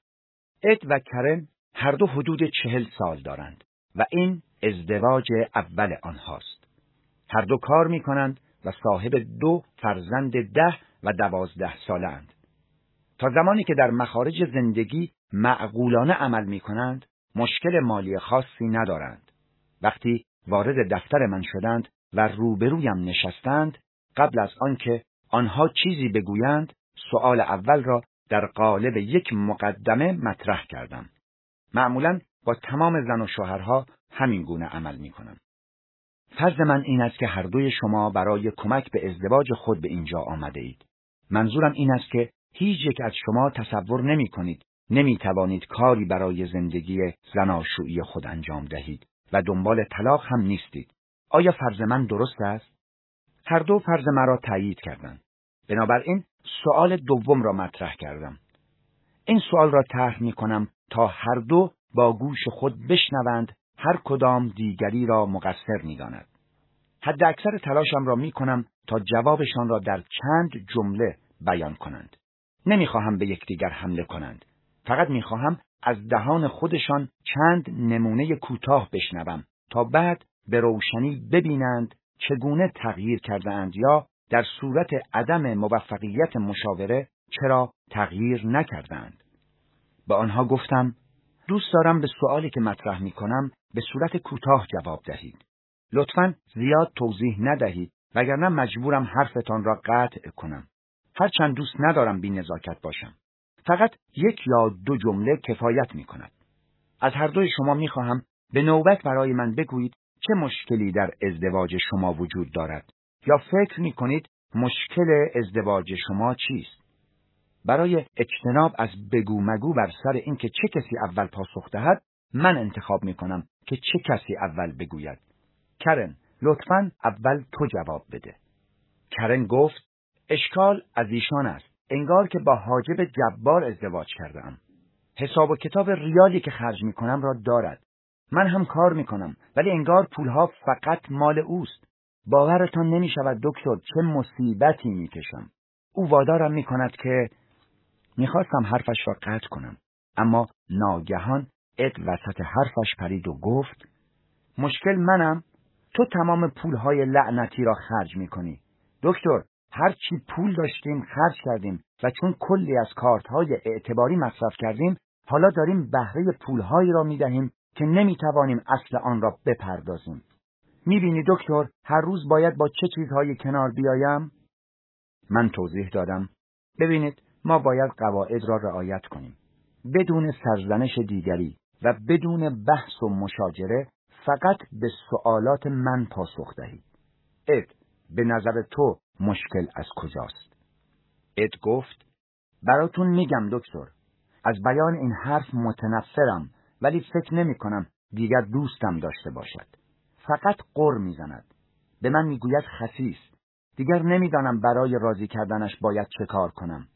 اد و کرن هر دو حدود چهل سال دارند و این ازدواج اول آنهاست. هر دو کار می کنند و صاحب دو فرزند ده و دوازده ساله اند. تا زمانی که در مخارج زندگی معقولانه عمل می کنند مشکل مالی خاصی ندارند. وقتی وارد دفتر من شدند و روبرویم نشستند قبل از آنکه آنها چیزی بگویند سؤال اول را در قالب یک مقدمه مطرح کردم. معمولاً با تمام زن و شوهرها همین گونه عمل می کنم. فرض من این است که هر دوی شما برای کمک به ازدواج خود به اینجا آمده اید. منظورم این است که هیچ یک از شما تصور نمی کنید نمی توانید کاری برای زندگی زناشویی خود انجام دهید و دنبال طلاق هم نیستید. آیا فرض من درست است؟ هر دو فرض مرا تایید کردند. بنابراین سؤال دوم را مطرح کردم. این سؤال را طرح می کنم تا هر دو با گوش خود بشنوند هر کدام دیگری را مقصر می داند. حد اکثر تلاشم را می کنم تا جوابشان را در چند جمله بیان کنند. نمی خواهم به یکدیگر حمله کنند. فقط می خواهم از دهان خودشان چند نمونه کوتاه بشنوم تا بعد به روشنی ببینند چگونه تغییر کرده اند یا در صورت عدم موفقیت مشاوره چرا تغییر نکردند. به آنها گفتم دوست دارم به سؤالی که مطرح می کنم به صورت کوتاه جواب دهید. لطفاً زیاد توضیح ندهید وگرنه مجبورم حرفتان را قطع کنم. هرچند دوست ندارم بی نزاکت باشم. فقط یک یا دو جمله کفایت می کند. از هر دوی شما می خواهم به نوبت برای من بگویید چه مشکلی در ازدواج شما وجود دارد یا فکر می کنید مشکل ازدواج شما چیست. برای اجتناب از بگو مگو بر سر اینکه چه کسی اول پاسخ دهد، من انتخاب می کنم که چه کسی اول بگوید. کرن، لطفاً اول تو جواب بده. کرن گفت: اشکال از ایشان است. انگار که با حاجب جبار ازدواج کردم. حساب و کتاب ریالی که خرج می کنم را دارد. من هم کار می کنم، ولی انگار پولها فقط مال اوست. باورتان نمی شود دکتر چه مصیبتی می کشم. او وادارم می کند که میخواستم حرفش را قطع کنم، اما ناگهان اد وسط حرفش پرید و گفت: مشکل منم؟ تو تمام پولهای لعنتی را خرج میکنی. دکتر، هر چی پول داشتیم خرج کردیم و چون کلی از کارتهای اعتباری مصرف کردیم، حالا داریم بهره پولهایی را میدهیم که نمیتوانیم اصل آن را بپردازیم. میبینی دکتر، هر روز باید با چه چیزهایی کنار بیایم؟ من توضیح دادم: ببینید، ما باید قواعد را رعایت کنیم. بدون سرزنش دیگری و بدون بحث و مشاجره فقط به سوالات من پاسخ دهید. اد، به نظر تو مشکل از کجاست؟ اد گفت: براتون میگم دکتر، از بیان این حرف متنفرم، ولی فکر نمی کنم دیگر دوستم داشته باشد. فقط غر میزند. به من میگوید خسیس. دیگر نمیدانم برای راضی کردنش باید چه کار کنم.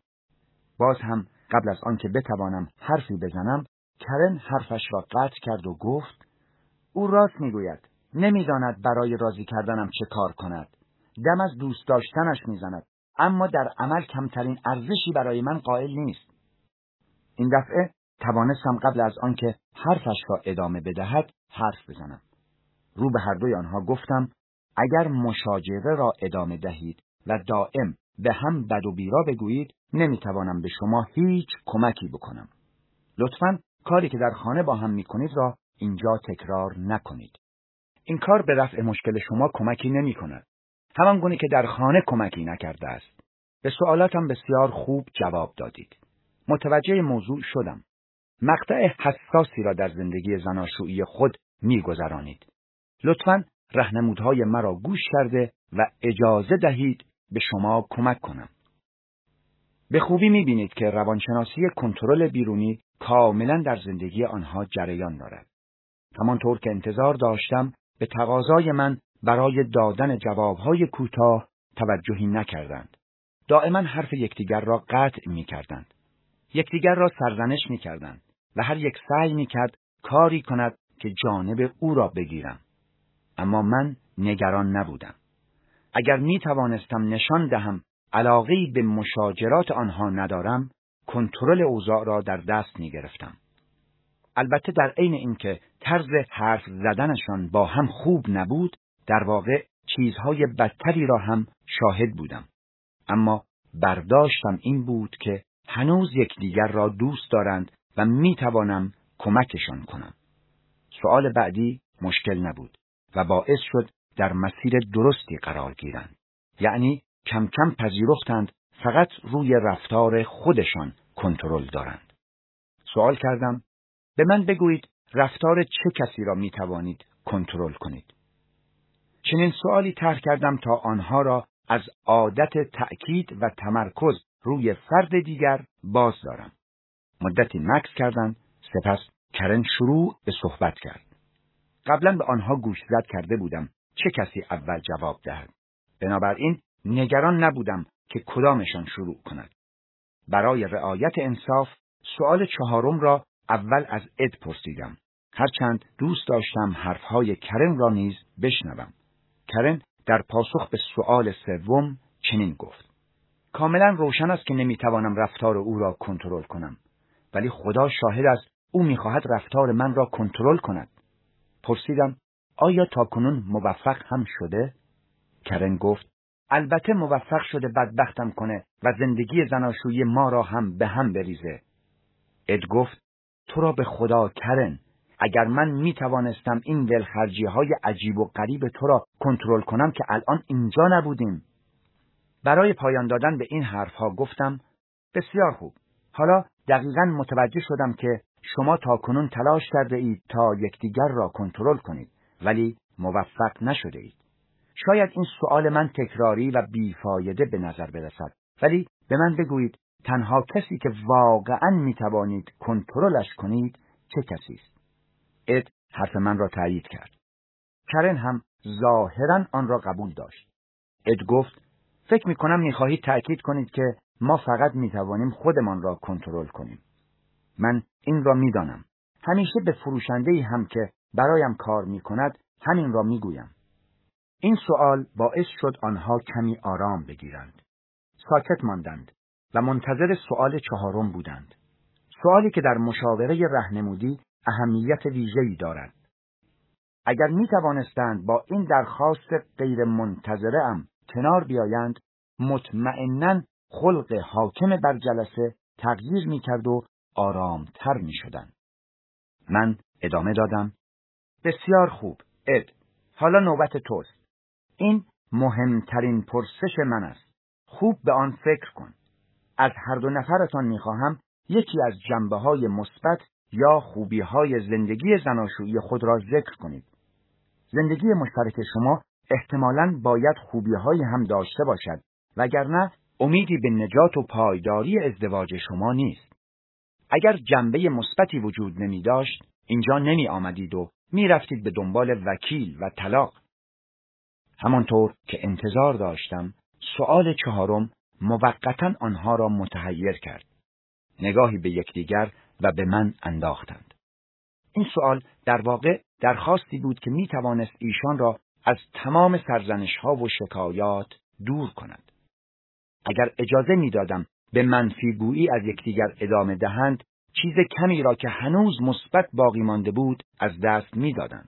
باز هم قبل از آن که بتوانم حرفی بزنم، کرن حرفش را قطع کرد و گفت: او راست میگوید. نمیداند برای راضی کردنم چه کار کند. دم از دوست داشتنش میزند، اما در عمل کمترین ارزشی برای من قائل نیست. این دفعه توانستم قبل از آن که حرفش را ادامه بدهد حرف بزنم. رو به هر دوی آنها گفتم: اگر مشاجره را ادامه دهید و دائم به هم بد و بیرا بگویید، نمیتوانم به شما هیچ کمکی بکنم. لطفاً کاری که در خانه با هم میکنید را اینجا تکرار نکنید. این کار به رفع مشکل شما کمکی نمی کند. همان گونه که در خانه کمکی نکرده است. به سوالاتم بسیار خوب جواب دادید. متوجه موضوع شدم. مقطع حساسی را در زندگی زناشویی خود میگذرانید. لطفاً راهنمودهای مرا گوش کرده و اجازه دهید به شما کمک کنم. به خوبی می‌بینید که روانشناسی کنترل بیرونی کاملاً در زندگی آنها جریان دارد. همانطور که انتظار داشتم، به تقاضای من برای دادن جوابهای کوتاه توجهی نکردند. دائما حرف یکدیگر را قطع می‌کردند. یکدیگر را سرزنش می‌کردند و هر یک سعی می‌کرد کاری کند که جانب او را بگیرم. اما من نگران نبودم. اگر می‌توانستم نشان دهم علاقه‌ای به مشاجرات آنها ندارم، کنترل اوضاع را در دست می‌گرفتم. البته در عین اینکه طرز حرف زدنشان با هم خوب نبود، در واقع چیزهای بدتری را هم شاهد بودم. اما برداشتم این بود که هنوز یکدیگر را دوست دارند و می‌توانم کمکشان کنم. سوال بعدی مشکل نبود و باعث شد در مسیر درستی قرار گیرند. یعنی کم کم پذیرفتند فقط روی رفتار خودشان کنترل دارند. سوال کردم: به من بگویید رفتار چه کسی را می توانید کنترل کنید؟ چنین سوالی طرح کردم تا آنها را از عادت تأکید و تمرکز روی فرد دیگر باز دارم. مدتی مکث کردند، سپس کرن شروع به صحبت کرد. قبلا به آنها گوشزد کرده بودم چه کسی اول جواب دهد. بنابراین نگران نبودم که کدامشان شروع کند. برای رعایت انصاف سوال چهارم را اول از اد پرسیدم، هرچند دوست داشتم حرفهای کرن را نیز بشنوم. کرن در پاسخ به سوال سوم چنین گفت: کاملا روشن است که نمیتوانم رفتار او را کنترل کنم، ولی خدا شاهد است او میخواهد رفتار من را کنترل کند. پرسیدم: آیا تاکنون موفق هم شده؟ کرن گفت: البته موفق شده بدبختم کنه و زندگی زناشویی ما را هم به هم بریزه. اد گفت: تو را به خدا کرن، اگر من می توانستم این دلخرجی های عجیب و غریب تو را کنترل کنم که الان اینجا نبودیم. برای پایان دادن به این حرف ها گفتم: بسیار خوب، حالا دقیقاً متوجه شدم که شما تاکنون تلاش کرده اید تا یکدیگر را کنترل کنید، ولی موفق نشده اید. شاید این سؤال من تکراری و بیفایده به نظر برسد، ولی به من بگویید تنها کسی که واقعاً میتوانید کنترلش کنید چه کسی است؟ اد حرف من را تایید کرد. کرن هم ظاهراً آن را قبول داشت. اد گفت: فکر میکنم میخواهید تأکید کنید که ما فقط میتوانیم خودمان را کنترل کنیم. من این را میدانم. همیشه به فروشنده‌ای هم که برایم کار میکند همین را میگویم. این سوال باعث شد آنها کمی آرام بگیرند. ساکت ماندند و منتظر سؤال چهارم بودند. سؤالی که در مشاوره راهنمودی اهمیت ویژه‌ای دارد. اگر می توانستند با این درخواست غیر منتظره ام کنار بیایند، مطمئناً خلق حاکم بر جلسه تغییر می کرد و آرامتر می شدند. من ادامه دادم: بسیار خوب، اد. حالا نوبت توست. این مهمترین پرسش من است. خوب به آن فکر کن. از هر دو نفرتان می خواهم یکی از جنبه‌های مثبت یا خوبی‌های زندگی زناشویی خود را ذکر کنید. زندگی مشترک شما احتمالاً باید خوبی‌هایی هم داشته باشد، وگرنه امیدی به نجات و پایداری ازدواج شما نیست. اگر جنبه مثبتی وجود نمی داشت، اینجا نمی آمدید و می رفتید به دنبال وکیل و طلاق. همانطور که انتظار داشتم، سؤال چهارم موقتاً آنها را متحیر کرد. نگاهی به یکدیگر و به من انداختند. این سؤال در واقع درخواستی بود که می توانست ایشان را از تمام سرزنش‌ها و شکایات دور کند. اگر اجازه می دادم به منفیگویی از یکدیگر ادامه دهند، چیز کمی را که هنوز مثبت باقی مانده بود از دست می دادند.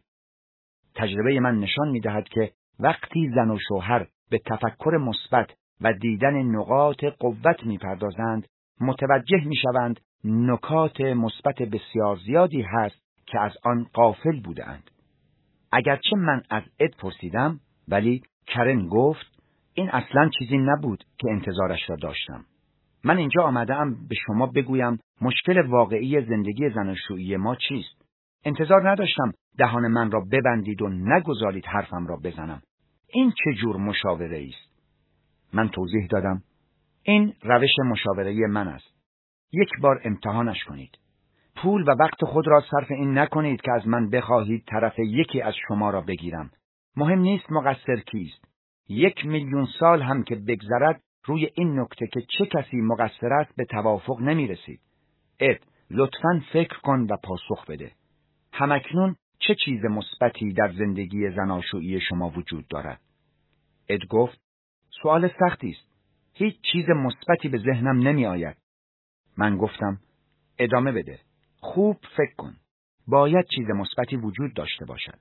تجربه من نشان می دهد که وقتی زن و شوهر به تفکر مثبت و دیدن نقاط قوت می پردازند، متوجه می شوند نکات مثبت بسیار زیادی هست که از آن غافل بودند. اگرچه من از اد پرسیدم، ولی کرن گفت: این اصلاً چیزی نبود که انتظارش را داشتم. من اینجا آمده‌ام به شما بگویم مشکل واقعی زندگی زناشویی ما چیست. انتظار نداشتم دهان من را ببندید و نگذارید حرفم را بزنم. این چه جور مشاوره است؟ من توضیح دادم: این روش مشاوره من است. یک بار امتحانش کنید. پول و وقت خود را صرف این نکنید که از من بخواهید طرف یکی از شما را بگیرم. مهم نیست مقصر کیست. یک میلیون سال هم که بگذرد روی این نکته که چه کسی مقصر است به توافق نمی رسید. اد، لطفاً فکر کن و پاسخ بده. همکنون چه چیز مثبتی در زندگی زناشویی شما وجود دارد؟ اد گفت: سوال سختی است. هیچ چیز مثبتی به ذهنم نمی آید. من گفتم: ادامه بده. خوب فکر کن. باید چیز مثبتی وجود داشته باشد.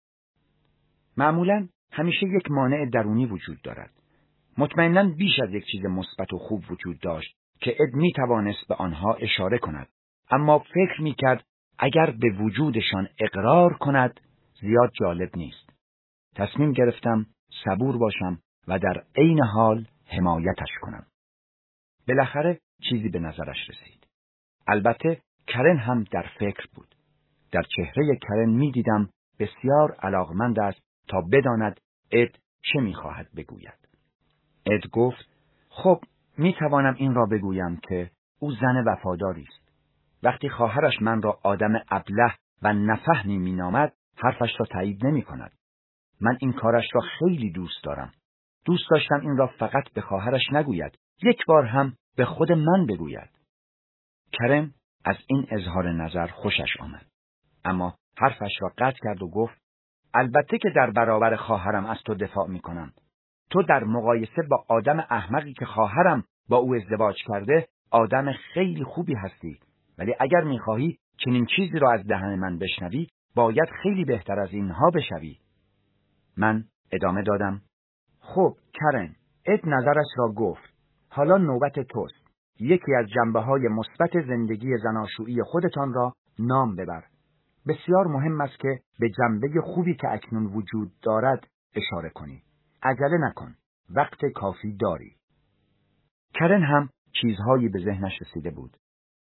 معمولاً همیشه یک مانع درونی وجود دارد. مطمئناً بیش از یک چیز مثبت و خوب وجود داشت که اد می توانست به آنها اشاره کند، اما فکر می کرد اگر به وجودشان اقرار کند زیاد جالب نیست. تصمیم گرفتم صبور باشم و در عین حال حمایتش کنم. بالاخره چیزی به نظرش رسید. البته کرن هم در فکر بود. در چهره کرن می دیدم بسیار علاقمند است تا بداند اد چه می خواهد بگوید. اد گفت: خب می توانم این را بگویم که او زن وفاداری است. وقتی خواهرش من را آدم ابله و نفهمی می نامد، حرفش را تایید نمی کند. من این کارش را خیلی دوست دارم. دوست داشتم این را فقط به خواهرش نگوید، یک بار هم به خود من بگوید. کرن از این اظهار نظر خوشش آمد، اما حرفش را قطع کرد و گفت: البته که در برابر خواهرم از تو دفاع می کنم. تو در مقایسه با آدم احمقی که خواهرم با او ازدواج کرده، آدم خیلی خوبی هستی، ولی اگر می خواهی چنین چیزی را از دهن من بشنوی، باید خیلی بهتر از اینها بشوی. من ادامه دادم: خب کرن، اد نظرش را گفت. حالا نوبت توست. یکی از جنبه‌های مثبت زندگی زناشویی خودتان را نام ببر. بسیار مهم است که به جنبه خوبی که اکنون وجود دارد اشاره کنی. عجله نکن. وقت کافی داری. کرن هم چیزهایی به ذهنش رسیده بود.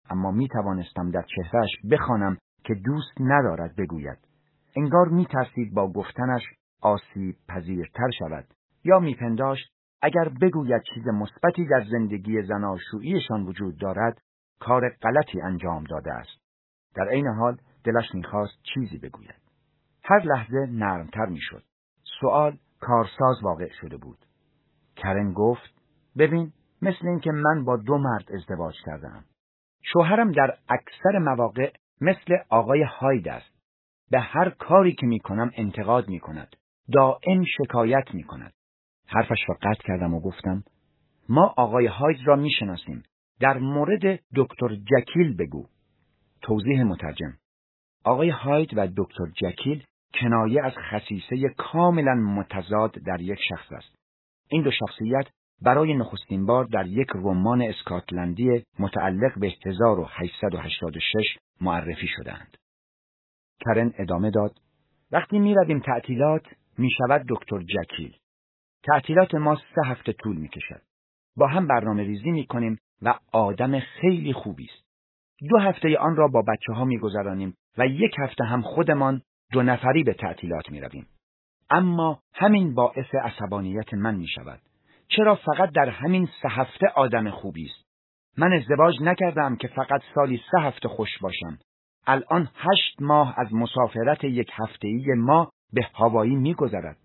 اما می توانستم در چهرهش بخوانم که دوست ندارد بگوید. انگار می ترسید با گفتنش آسیب پذیرتر شود، یا می پنداشت اگر بگوید چیز مثبتی در زندگی زناشوییشان وجود دارد، کار غلطی انجام داده است. در عین حال دلش می خواست چیزی بگوید. هر لحظه نرمتر می شد. سوال کارساز واقع شده بود. کرن گفت: ببین، مثل این که من با دو مرد ازدواج کردم. شوهرم در اکثر مواقع مثل آقای هاید است. به هر کاری که می کنم انتقاد می کند. دائم شکایت می کند. حرفش را قطع کردم و گفتم: ما آقای هاید را می شناسیم. در مورد دکتر جکیل بگو. توضیح مترجم: آقای هاید و دکتر جکیل کنایه از خصیصه کاملا متضاد در یک شخص است. این دو شخصیت برای نخستین بار در یک رمان اسکاتلندی متعلق به هزار و هشتصد و هشتاد و شش معرفی شدند. کرن ادامه داد: وقتی می رویم تعطیلات می شود دکتر جکیل. تعطیلات ما سه هفته طول می کشد. با هم برنامه ریزی می کنیم و آدم خیلی خوبی است. دو هفته آن را با بچه ها می گذرانیم و یک هفته هم خودمان دو نفری به تعطیلات می رویم. اما همین باعث عصبانیت من می شود. چرا فقط در همین سه هفته آدم خوبی است؟ من ازدواج نکردم که فقط سالی سه هفته خوش باشم. الان هشت ماه از مسافرت یک هفته‌ای ما به هاوایی می گذرد.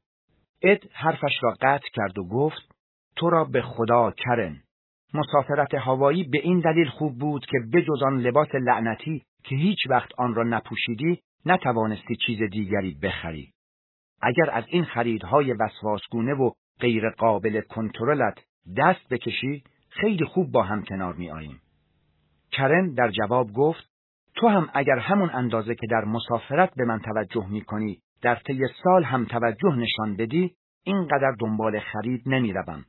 اد حرفش را قطع کرد و گفت: تو را به خدا کرن، مسافرت هاوایی به این دلیل خوب بود که بجز آن لباس لعنتی که هیچ وقت آن را نپوشیدی نتوانستی چیز دیگری بخری. اگر از این خریدهای وسواسگونه و غیر قابل کنترلت دست بکشی، خیلی خوب با هم کنار می آییم. کرن در جواب گفت: تو هم اگر همون اندازه که در مسافرت به من توجه می کنی در طی سال هم توجه نشان بدی، اینقدر دنبال خرید نمی روم.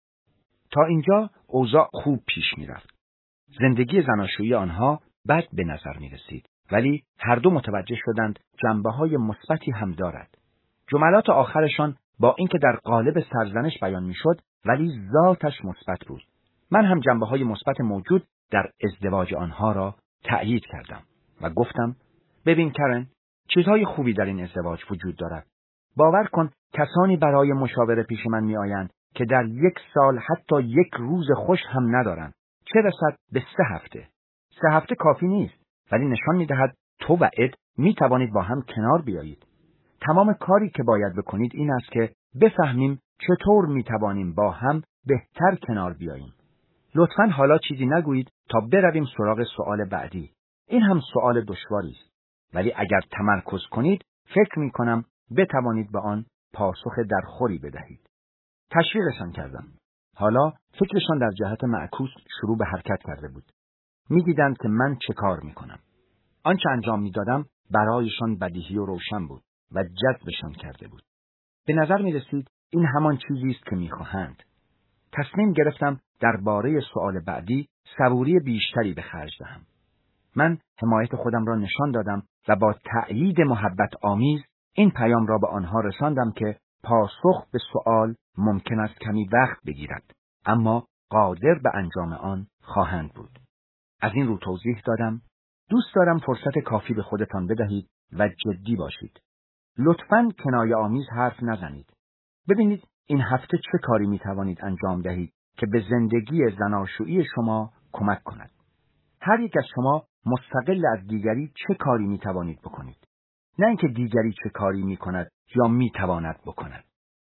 تا اینجا اوضاع خوب پیش می رفت. زندگی زناشویی آنها بد به نظر می رسید، ولی هر دو متوجه شدند جنبه های مثبتی هم دارد. جملات آخرشان با اینکه در قالب سرزنش بیان می شد، ولی ذاتش مثبت بود. من هم جنبه های مثبت موجود در ازدواج آنها را تأیید کردم و گفتم: ببین کرن، چیزهای خوبی در این ازدواج وجود دارد. باور کن کسانی برای مشاوره پیش من می آیند که در یک سال حتی یک روز خوش هم ندارند. چه رسد به سه هفته. سه هفته کافی نیست، ولی نشان می دهد تو و اد می توانید با هم کنار بیایید. تمام کاری که باید بکنید این است که بفهمیم چطور می توانیم با هم بهتر کنار بیاییم. لطفاً حالا چیزی نگویید تا برویم سراغ سوال بعدی. این هم سوال دشواری است، ولی اگر تمرکز کنید فکر می کنم بتوانید به آن پاسخ درخوری بدهید. تشویقشان کردم. حالا فکرشان در جهت معکوس شروع به حرکت کرده بود. می دیدند که من چه کار می کنم. آنچه انجام می دادم برایشان بدیهی و روشن بود و جذبشان کرده بود. به نظر می رسید این همان چیزی است که می خواهند. تصمیم گرفتم درباره سوال بعدی صبوری بیشتری به خرج دهم. من حمایت خودم را نشان دادم و با تأیید محبت آمیز این پیام را به آنها رساندم که پاسخ به سوال ممکن است کمی وقت بگیرد، اما قادر به انجام آن خواهند بود. از این رو توضیح دادم: دوست دارم فرصت کافی به خودتان بدهید و جدی باشید. لطفاً کنایه آمیز حرف نزنید. ببینید این هفته چه کاری می توانید انجام دهید که به زندگی زناشویی شما کمک کند. هر یک از شما مستقل از دیگری چه کاری می توانید بکنید، نه اینکه دیگری چه کاری می کند یا می تواند بکند.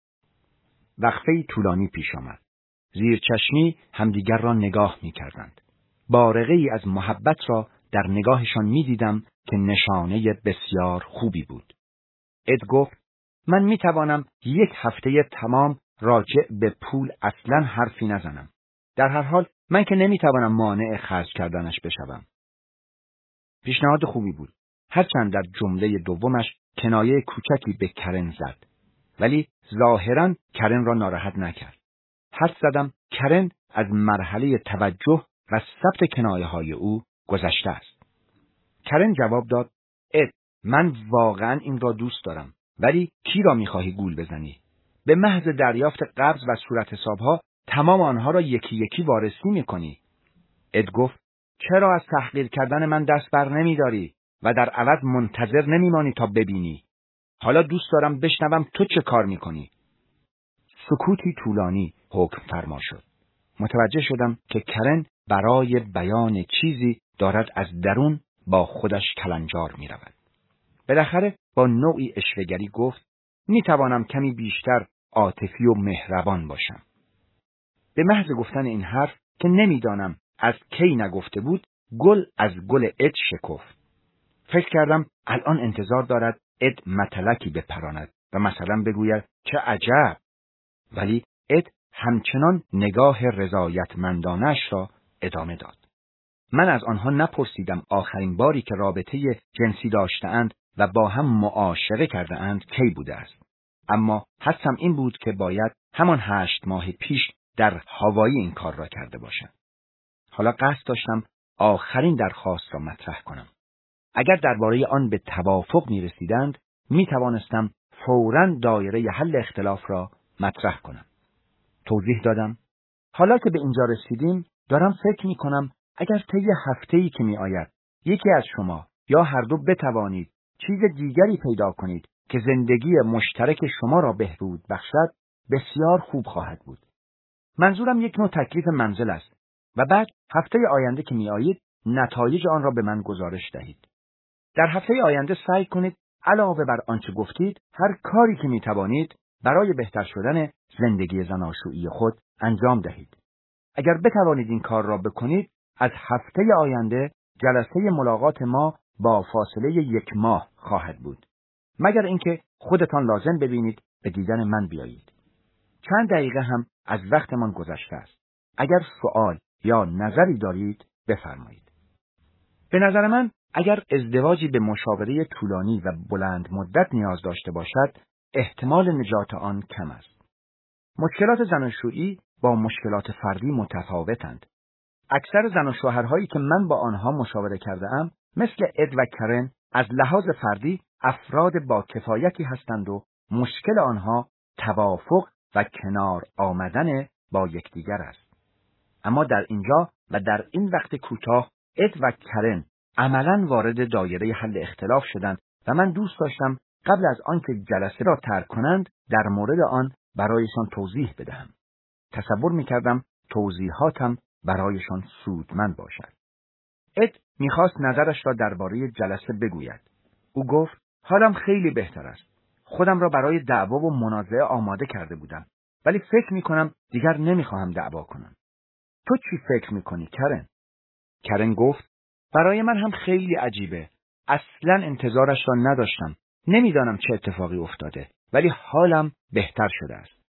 وقفه طولانی پیش آمد. زیر چشمی همدیگر را نگاه می کردند. بارقه ای از محبت را در نگاهشان می دیدم که نشانه بسیار خوبی بود. اد گفت: من می توانم یک هفته تمام راجع به پول اصلاً حرفی نزنم. در هر حال من که نمی توانم مانع خرج کردنش بشوم. پیشنهاد خوبی بود. هرچند در جمله دومش کنایه کوچکی به کرن زد، ولی ظاهراً کرن را ناراحت نکرد. حد زدم کرن از مرحله توجه و ثبت کنایه های او گذشته است. کرن جواب داد: اد، من واقعاً این را دوست دارم، ولی کی را می‌خواهی گول بزنی؟ به محض دریافت قبض و صورت حسابها تمام آنها را یکی یکی وارسی می‌کنی. اد گفت: چرا از تحقیر کردن من دست بر نمی‌داری و در عوض منتظر نمی‌مانی تا ببینی؟ حالا دوست دارم بشنوم تو چه کار می‌کنی. سکوتی طولانی حکم فرما شد. متوجه شدم که کرن برای بیان چیزی دارد از درون با خودش کلنجار می‌رود. بالاخره با نوعی اشوه‌گری گفت: می‌توانم کمی بیشتر عاطفی و مهربان باشم. به محض گفتن این حرف که نمی‌دانم از کی نگفته بود، گل از گل اد شکفت. فکر کردم الان انتظار دارد اد متلکی بپراند و مثلا بگوید چه عجب، ولی اد همچنان نگاه رضایتمندانش را ادامه داد. من از آنها نپرسیدم آخرین باری که رابطه جنسی داشته‌اند و با هم معاشقه کرده‌اند کی بوده است، اما حدسم این بود که باید همان هشت ماه پیش در هاوایی این کار را کرده باشد. حالا قصد داشتم آخرین درخواست را مطرح کنم. اگر درباره آن به توافق می رسیدند، می توانستم فوراً دایره حل اختلاف را مطرح کنم. توضیح دادم: حالا که به اینجا رسیدیم، دارم فکر می کنم اگر طی هفته‌ای که می آید یکی از شما یا هر دو بتوانید چیز دیگری پیدا کنید که زندگی مشترک شما را بهبود بخشد، بسیار خوب خواهد بود. منظورم یک نوع تکلیف منزل است و بعد هفته آینده که می آیید نتایج آن را به من گزارش دهید. در هفته آینده سعی کنید علاوه بر آنچه گفتید هر کاری که می توانید برای بهتر شدن زندگی زناشویی خود انجام دهید. اگر بتوانید این کار را بکنید، از هفته آینده جلسه ملاقات ما با فاصله یک ماه خواهد بود. مگر اینکه خودتان لازم ببینید به دیدن من بیایید. چند دقیقه هم از وقتمان گذشته است. اگر سوال یا نظری دارید بفرمایید. به نظر من اگر ازدواجی به مشاوره طولانی و بلند مدت نیاز داشته باشد، احتمال نجات آن کم است. مشکلات زناشویی با مشکلات فردی متفاوتند. اکثر زن و شوهرهایی که من با آنها مشاوره کرده‌ام، مثل اد و کرن، از لحاظ فردی افراد با کفایتی هستند و مشکل آنها توافق و کنار آمدن با یکدیگر است. اما در اینجا و در این وقت کوتاه اد و کرن عملاً وارد دایره حل اختلاف شدند و من دوست داشتم قبل از آنکه جلسه را ترک کنند در مورد آن برایشان توضیح بدهم. تصور می‌کردم توضیحاتم برایشان سودمند باشد. اد می‌خواست نظرش را درباره جلسه بگوید. او گفت: حالم خیلی بهتر است. خودم را برای دعوا و منازعه آماده کرده بودم، ولی فکر می‌کنم دیگر نمی‌خواهم دعوا کنم. تو چی فکر می‌کنی کرن؟ کرن گفت: برای من هم خیلی عجیبه. اصلاً انتظارش را نداشتم. نمی‌دانم چه اتفاقی افتاده، ولی حالم بهتر شده است.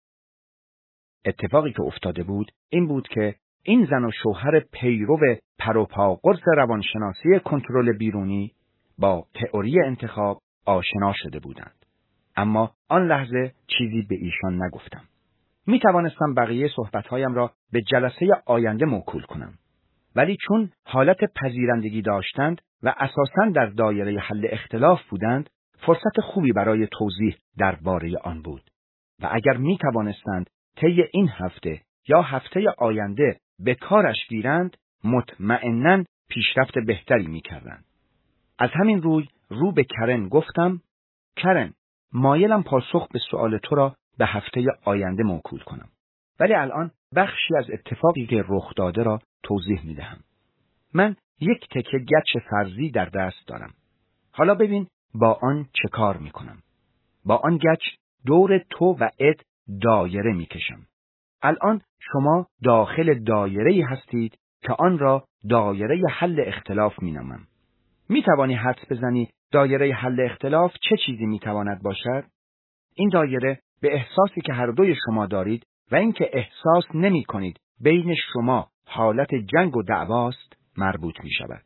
اتفاقی که افتاده بود این بود که این زن و شوهر پیرو پروپا قرص روانشناسی کنترل بیرونی با تئوری انتخاب آشنا شده بودند. اما آن لحظه چیزی به ایشان نگفتم. می توانستم بقیه صحبتهایم را به جلسه آینده موکول کنم. ولی چون حالت پذیرندگی داشتند و اساساً در دایره حل اختلاف بودند، فرصت خوبی برای توضیح درباره آن بود. و اگر می توانستند طی این هفته یا هفته آینده به کارش گیرند، مطمئناً پیشرفت بهتری می کردند. از همین روی رو به کرن گفتم: کرن، مایلم پاسخ به سؤال تو را به هفته آینده موکول کنم. ولی الان بخشی از اتفاقی که رخ داده را توضیح می دهم. من یک تکه گچ فرضی در دست دارم. حالا ببین با آن چه کار می کنم. با آن گچ دور تو و اد دایره می کشم. الان شما داخل دایره‌ای هستید که آن را دایره حل اختلاف می نامم. می توانی حدس بزنی دایره حل اختلاف چه چیزی می تواند باشد؟ این دایره به احساسی که هر دوی شما دارید و اینکه احساس نمی کنید بین شما حالت جنگ و دعواست مربوط می شود.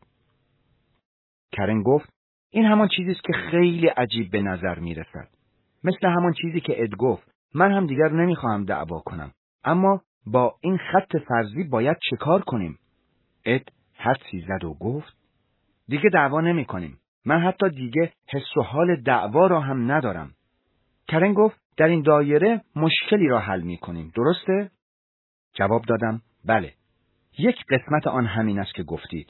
کرن گفت: این همان چیزی است که خیلی عجیب به نظر می رسد. مثل همان چیزی که اد گفت: من هم دیگر نمی خواهم دعوا کنم. اما با این خط فرضی باید چه کار کنیم؟ اد حدسی زد و گفت: دیگه دعوا نمی کنیم. من حتی دیگه حس و حال دعوا را هم ندارم. کرن گفت: در این دایره مشکلی را حل می کنیم. درسته؟ جواب دادم: بله. یک قسمت آن همین است که گفتید.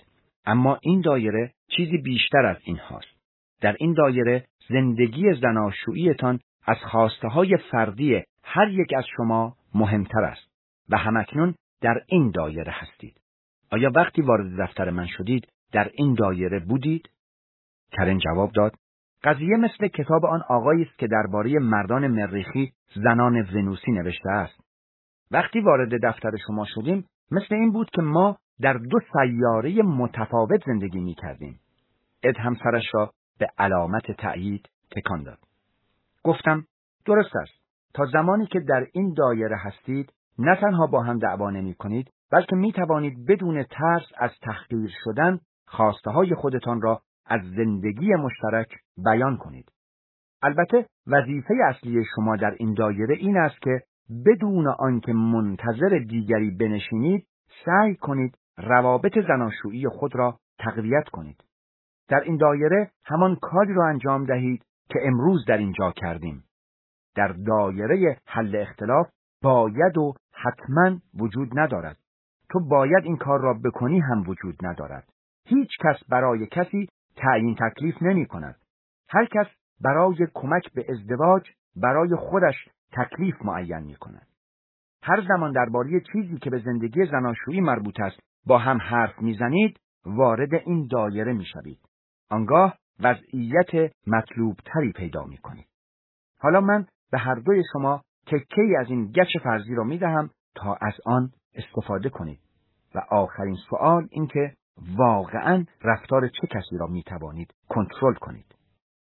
اما این دایره چیزی بیشتر از این هاست. در این دایره زندگی زناشوییتان از خواسته‌های فردی هر یک از شما مهمتر است و همکنون در این دایره هستید. آیا وقتی وارد دفتر من شدید در این دایره بودید؟ کرن جواب داد: قضیه مثل کتاب آن آقایی است که درباره مردان مریخی زنان ونوسی نوشته است. وقتی وارد دفتر شما شدیم مثل این بود که ما در دو سیاره متفاوت زندگی می کردیم. اد هم سرش را به علامت تأیید تکان داد. گفتم: درست است. تا زمانی که در این دایره هستید نه تنها با هم دعوا نمی کنید بلکه می توانید بدون ترس از تحقیر شدن خواسته های خودتان را از زندگی مشترک بیان کنید. البته وظیفه اصلی شما در این دایره این است که بدون آنکه منتظر دیگری بنشینید سعی کنید روابط زناشویی خود را تقویت کنید. در این دایره همان کاری را انجام دهید که امروز در اینجا کردیم. در دایره حل اختلاف باید و حتما وجود ندارد. تو باید این کار را بکنی هم وجود ندارد. هیچ کس برای کسی تعیین تکلیف نمی کند. هر کس برای کمک به ازدواج برای خودش تکلیف معین می کند. هر زمان درباره چیزی که به زندگی زناشویی مربوط است با هم حرف می زنید وارد این دایره می شوید. آنگاه وضعیت مطلوب تری پیدا می کنید. حالا من به هر دوی شما تکه‌ای از این گچ فرضی را می دهم تا از آن استفاده کنید. و آخرین سوال این که واقعاً رفتار چه کسی را می توانید کنترل کنید.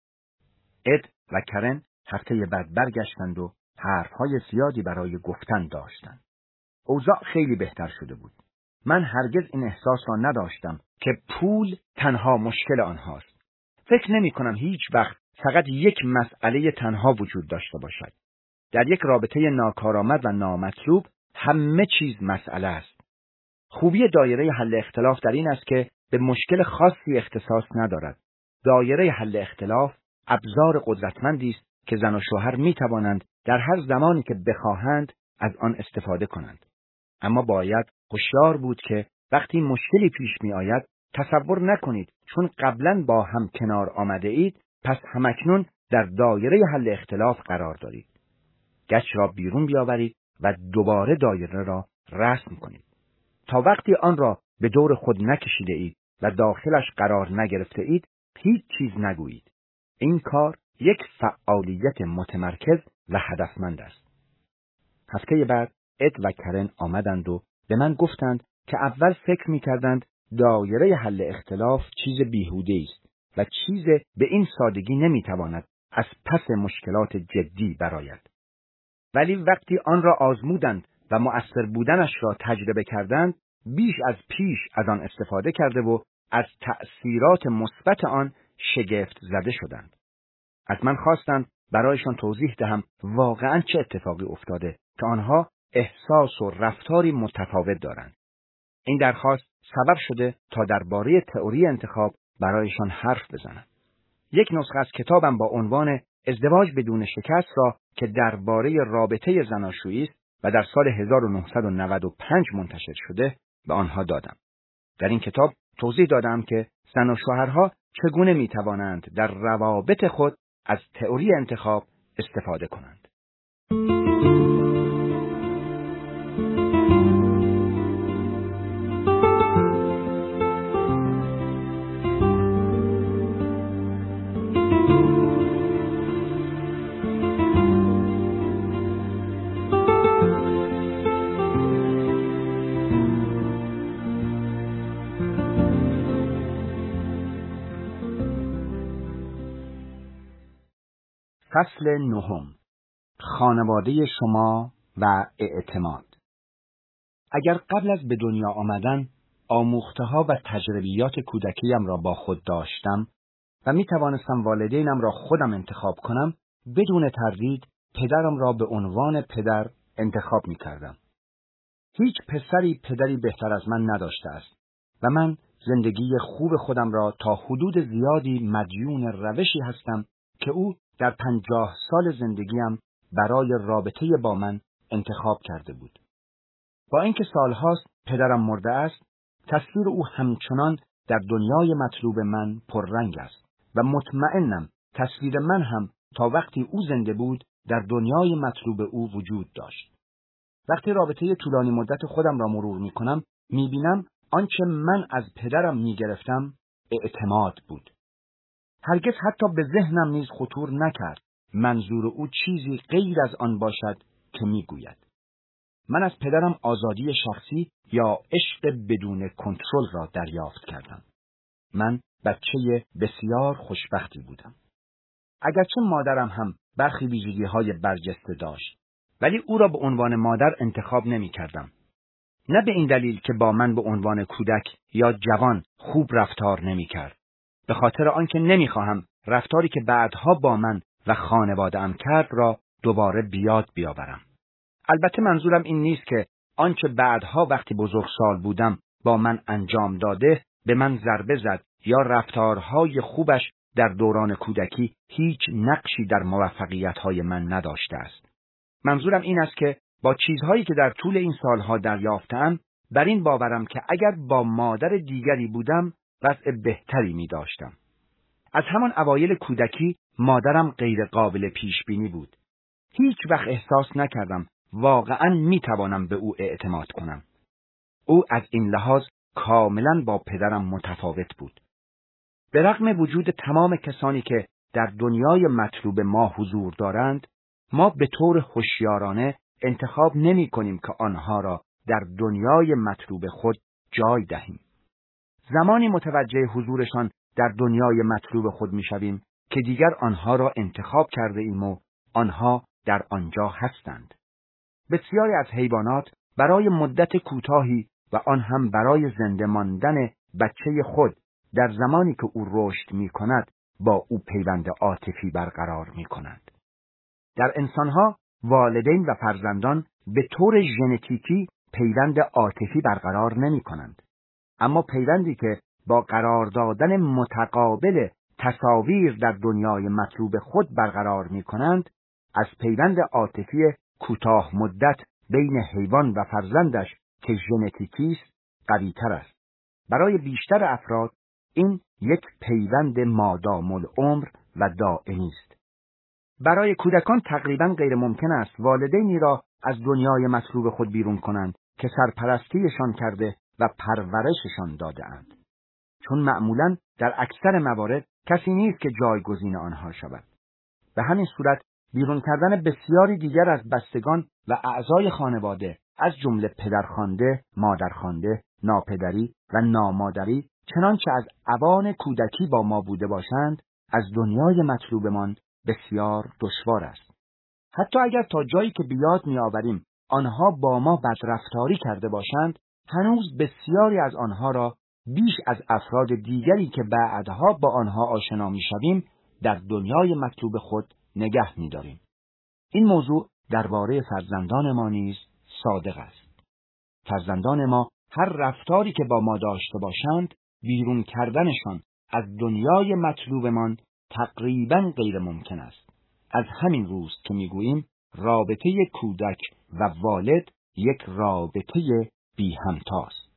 اد و کرن هفته بعد برگشتند و حرفهای زیادی برای گفتن داشتند. اوضاع خیلی بهتر شده بود. من هرگز این احساس را نداشتم که پول تنها مشکل آنهاست. فکر نمی کنم هیچ وقت فقط یک مسئله تنها وجود داشته باشد. در یک رابطه ناکارآمد و نامطلوب همه چیز مسئله است. خوبی دایره حل اختلاف در این است که به مشکل خاصی اختصاص ندارد. دایره حل اختلاف ابزار قدرتمندی است که زن و شوهر می توانند در هر زمانی که بخواهند از آن استفاده کنند. اما باید هوشیار بود که وقتی مشکلی پیش می آید تصور نکنید چون قبلا با هم کنار آمده اید پس همکنون در دایره حل اختلاف قرار دارید. گچ را بیرون بیاورید و دوباره دایره را رسم کنید. تا وقتی آن را به دور خود نکشیده اید و داخلش قرار نگرفته اید هیچ چیز نگویید. این کار یک فعالیت متمرکز و هدفمند است. هفته بعد اد و کرن آمدند و به من گفتند که اول فکر می کردند دایره حل اختلاف چیز بیهوده است و چیز به این سادگی نمی تواند از پس مشکلات جدی برآید. ولی وقتی آن را آزمودند و مؤثر بودنش را تجربه کردند بیش از پیش از آن استفاده کرده و از تأثیرات مثبت آن شگفت زده شدند. از من خواستند برایشان توضیح دهم واقعاً چه اتفاقی افتاده که آنها احساس و رفتاری متفاوت دارند. این درخواست سبب شده تا درباره تئوری انتخاب برایشان حرف بزنم. یک نسخه از کتابم با عنوان ازدواج بدون شکست را که درباره رابطه زناشویی است و در سال هزار و نهصد و نود و پنج منتشر شده به آنها دادم. در این کتاب توضیح دادم که زن و شوهرها چگونه می توانند در روابط خود از تئوری انتخاب استفاده کنند. فصل نهم. خانواده شما و اعتماد. اگر قبل از به دنیا آمدن آموخته‌ها و تجربیات کودکیم را با خود داشتم و می توانستم والدینم را خودم انتخاب کنم، بدون تردید پدرم را به عنوان پدر انتخاب می کردم. هیچ پسری پدری بهتر از من نداشته است و من زندگی خوب خودم را تا حدود زیادی مدیون روشی هستم که او در پنجاه سال زندگیم برای رابطه با من انتخاب کرده بود. با اینکه سالهاست پدرم مرده است، تصویر او همچنان در دنیای مطلوب من پررنگ است و مطمئنم تصویر من هم تا وقتی او زنده بود در دنیای مطلوب او وجود داشت. وقتی رابطه طولانی مدت خودم را مرور می کنم، می بینم آنچه من از پدرم می گرفتم اعتماد بود. هرگز حتی به ذهنم نیز خطور نکرد منظور او چیزی غیر از آن باشد که می گوید. من از پدرم آزادی شخصی یا عشق بدون کنترل را دریافت کردم. من بچه بسیار خوشبختی بودم. اگرچه مادرم هم برخی ویژگی‌های برجسته داشت، ولی او را به عنوان مادر انتخاب نمی کردم. نه به این دلیل که با من به عنوان کودک یا جوان خوب رفتار نمی کرد. به خاطر آنکه نمی خواهم رفتاری که بعدها با من و خانواده‌ام کرد را دوباره بیاد بیاورم. البته منظورم این نیست که آنچه بعدها وقتی بزرگسال بودم با من انجام داده به من ضربه زد یا رفتارهای خوبش در دوران کودکی هیچ نقشی در موفقیت‌های من نداشته است. منظورم این است که با چیزهایی که در طول این سالها دریافتم بر این باورم که اگر با مادر دیگری بودم وضع بهتری می داشتم. از همان اوایل کودکی مادرم غیر قابل پیش بینی بود. هیچ وقت احساس نکردم واقعاً می توانم به او اعتماد کنم. او از این لحاظ کاملاً با پدرم متفاوت بود. به رغم وجود تمام کسانی که در دنیای مطلوب ما حضور دارند، ما به طور هوشیارانه انتخاب نمی کنیم که آنها را در دنیای مطلوب خود جای دهیم. زمانی متوجه حضورشان در دنیای مطلوب خود می شویم که دیگر آنها را انتخاب کرده ایم و آنها در آنجا هستند. بسیاری از حیوانات برای مدت کوتاهی و آن هم برای زنده ماندن بچه خود در زمانی که او رشد می کند با او پیوند عاطفی برقرار می کنند. در انسانها والدین و فرزندان به طور ژنتیکی پیوند عاطفی برقرار نمی کنند. اما پیوندی که با قرار دادن متقابل تصاویر در دنیای مطلوب خود برقرار می کنند، از پیوند عاطفی کوتاه مدت بین حیوان و فرزندش که ژنتیکی است قوی‌تر است. برای بیشتر افراد این یک پیوند مادام العمر و دائمی است. برای کودکان تقریباً غیر ممکن است والدینی را از دنیای مطلوب خود بیرون کنند که سرپرستیشان کرده و پرورششان داده اند. چون معمولاً در اکثر موارد کسی نیست که جایگزین آنها شود. به همین صورت بیرون کردن بسیاری دیگر از بستگان و اعضای خانواده از جمله پدرخوانده، مادرخوانده، ناپدری و نامادری چنانچه از اوان کودکی با ما بوده باشند از دنیای مطلوبمان بسیار دشوار است. حتی اگر تا جایی که بیاد می‌آوریم آنها با ما بدرفتاری کرده باشند، هنوز بسیاری از آنها را بیش از افراد دیگری که بعدها با آنها آشنا می‌شویم در دنیای مطلوب خود نگه می‌داریم. این موضوع درباره فرزندان ما نیز صادق است. فرزندان ما هر رفتاری که با ما داشته باشند، بیرون کردنشان از دنیای مطلوبمان تقریباً غیر ممکن است. از همین روز که میگوییم رابطه کودک و والد یک رابطه بی همتاست.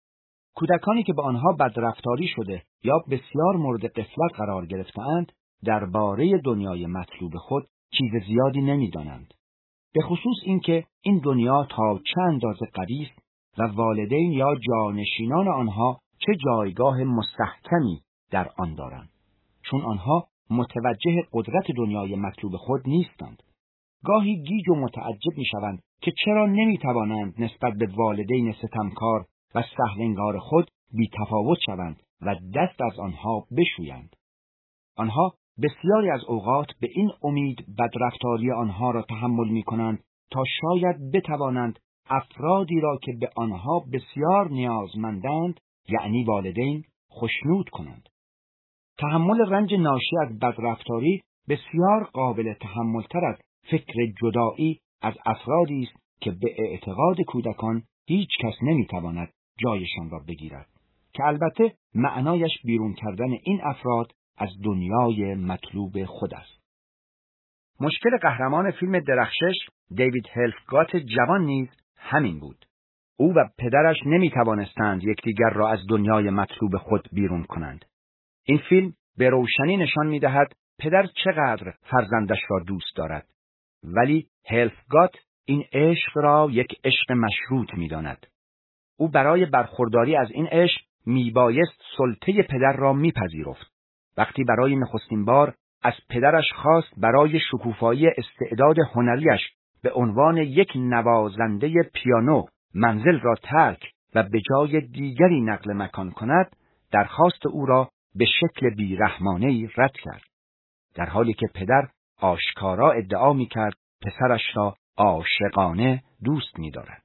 کودکانی که به آنها بدرفتاری شده یا بسیار مورد غفلت قرار گرفته‌اند درباره دنیای مطلوب خود چیز زیادی نمی‌دانند. به خصوص اینکه این دنیا تا چه اندازه قوی است و والدین یا جانشینان آنها چه جایگاه مستحکمی در آن دارند، چون آنها متوجه قدرت دنیای مطلوب خود نیستند. گاهی گیج و متعجب می‌شوند که چرا نمی‌توانند نسبت به والدین ستمکار و سهل‌انگار خود بی‌تفاوت شوند و دست از آنها بشویند. آنها بسیاری از اوقات به این امید بدرفتاری آنها را تحمل می‌کنند تا شاید بتوانند افرادی را که به آنها بسیار نیازمندند، یعنی والدین، خوشنود کنند. تحمل رنج ناشی از بدرفتاری بسیار قابل تحمل‌تر از فکر جدایی از افرادی است که به اعتقاد کودکان هیچ کس نمی‌تواند جایشان را بگیرد، که البته معنایش بیرون کردن این افراد از دنیای مطلوب خود است. مشکل قهرمان فیلم درخشش دیوید هلفگات جوان نیز همین بود. او و پدرش نمی توانستند یکدیگر را از دنیای مطلوب خود بیرون کنند. این فیلم به روشنی نشان می دهد پدر چقدر فرزندش را دوست دارد، ولی هلفگات این عشق را یک عشق مشروط می داند. او برای برخورداری از این عشق می بایست سلطه پدر را می پذیرفت. وقتی برای نخستین بار از پدرش خواست برای شکوفایی استعداد هنریش به عنوان یک نوازنده پیانو منزل را ترک و به جای دیگری نقل مکان کند، درخواست او را به شکل بیرحمانه‌ای رد کرد، در حالی که پدر آشکارا ادعا می‌کرد پسرش را عاشقانه دوست می‌دارد.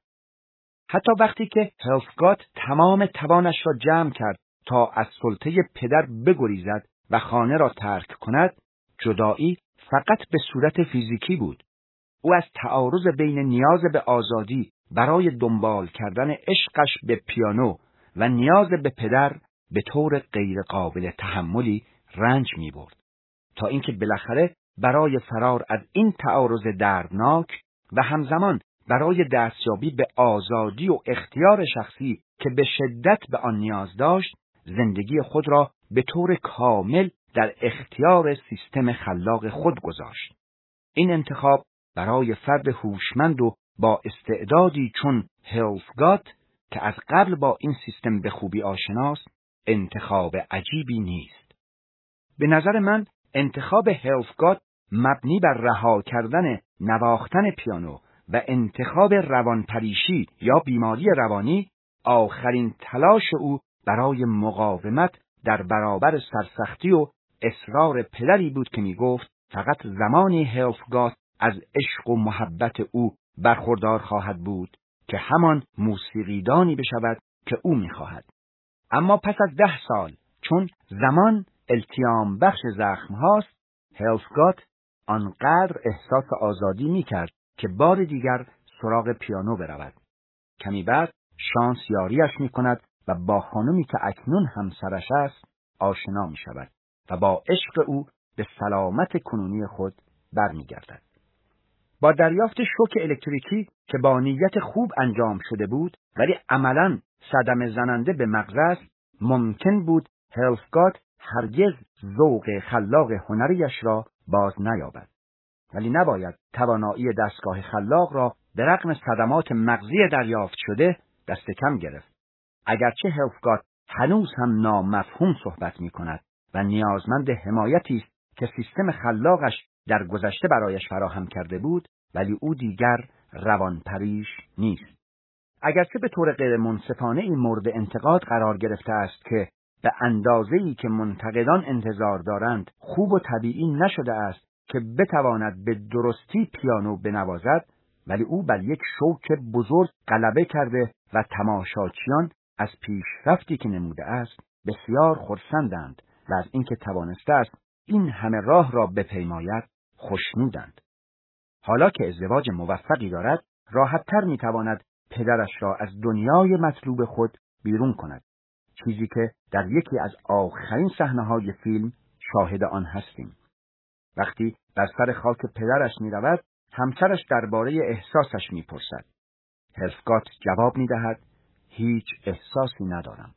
حتی وقتی که هلفگات تمام توانش را جمع کرد تا از سلطه پدر بگریزد و خانه را ترک کند، جدایی فقط به صورت فیزیکی بود. او از تعارض بین نیاز به آزادی برای دنبال کردن عشقش به پیانو و نیاز به پدر به طور غیر قابل تحملی رنج می برد، تا اینکه بالاخره برای فرار از این تعارض دردناک و همزمان برای دستیابی به آزادی و اختیار شخصی که به شدت به آن نیاز داشت، زندگی خود را به طور کامل در اختیار سیستم خلاق خود گذاشت. این انتخاب برای فرد هوشمند و با استعدادی چون هلفگات که از قبل با این سیستم به خوبی آشناست، انتخاب عجیبی نیست. به نظر من انتخاب هلفگات مبنی بر رها کردن نواختن پیانو و انتخاب روانپریشی یا بیماری روانی آخرین تلاش او برای مقاومت در برابر سرسختی و اصرار پدری بود که می گفت فقط زمانی هلفگات از عشق و محبت او برخوردار خواهد بود که همان موسیقیدانی بشود که او می خواهد. اما پس از ده سال، چون زمان التیام بخش زخم هاست، هلفگات آنقدر احساس آزادی می کرد که بار دیگر سراغ پیانو برود. کمی بعد شانس یاریش می کند و با خانمی که اکنون همسرش است آشنا می شود و با عشق او به سلامت کنونی خود برمی گردد. با دریافت شوک الکتریکی که با نیت خوب انجام شده بود ولی عملاً صدمه زننده به مغز است، ممکن بود هلفگات هرگز ذوق خلاق هنریش را باز نیابد. ولی نباید توانایی دستگاه خلاق را به رغم صدمات مغزی دریافت شده دست کم گرفت. اگرچه هلفگات هنوز هم نامفهوم صحبت می کند و نیازمند حمایتی است که سیستم خلاقش در گذشته برایش فراهم کرده بود، ولی او دیگر روانپریش نیست. اگرچه به طور غیر منصفانه این مورد انتقاد قرار گرفته است که به اندازه‌ای که منتقدان انتظار دارند خوب و طبیعی نشده است که بتواند به درستی پیانو بنوازد، ولی او بر یک شوک بزرگ غلبه کرده و تماشاچیان از پیشرفتی که نموده است بسیار خرسندند و از اینکه توانسته است این همه راه را بپیماید خوشنودند. حالا که ازدواج موفقی دارد، راحت‌تر می‌تواند پدرش را از دنیای مطلوب خود بیرون کند، چیزی که در یکی از آخرین صحنه‌های فیلم شاهد آن هستیم. وقتی بر سر خاک پدرش می‌رود، همسرش درباره احساسش می‌پرسد. هلفگات جواب می‌دهد: هیچ احساسی ندارم.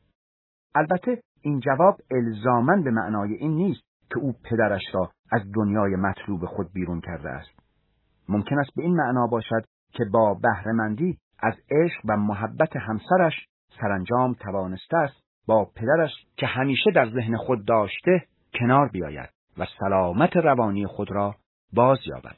البته این جواب الزاماً به معنای این نیست که او پدرش را از دنیای مطلوب خود بیرون کرده است. ممکن است به این معنا باشد که با بهره‌مندی از عشق و محبت همسرش سرانجام توانسته است با پدرش که همیشه در ذهن خود داشته کنار بیاید و سلامت روانی خود را باز یابد.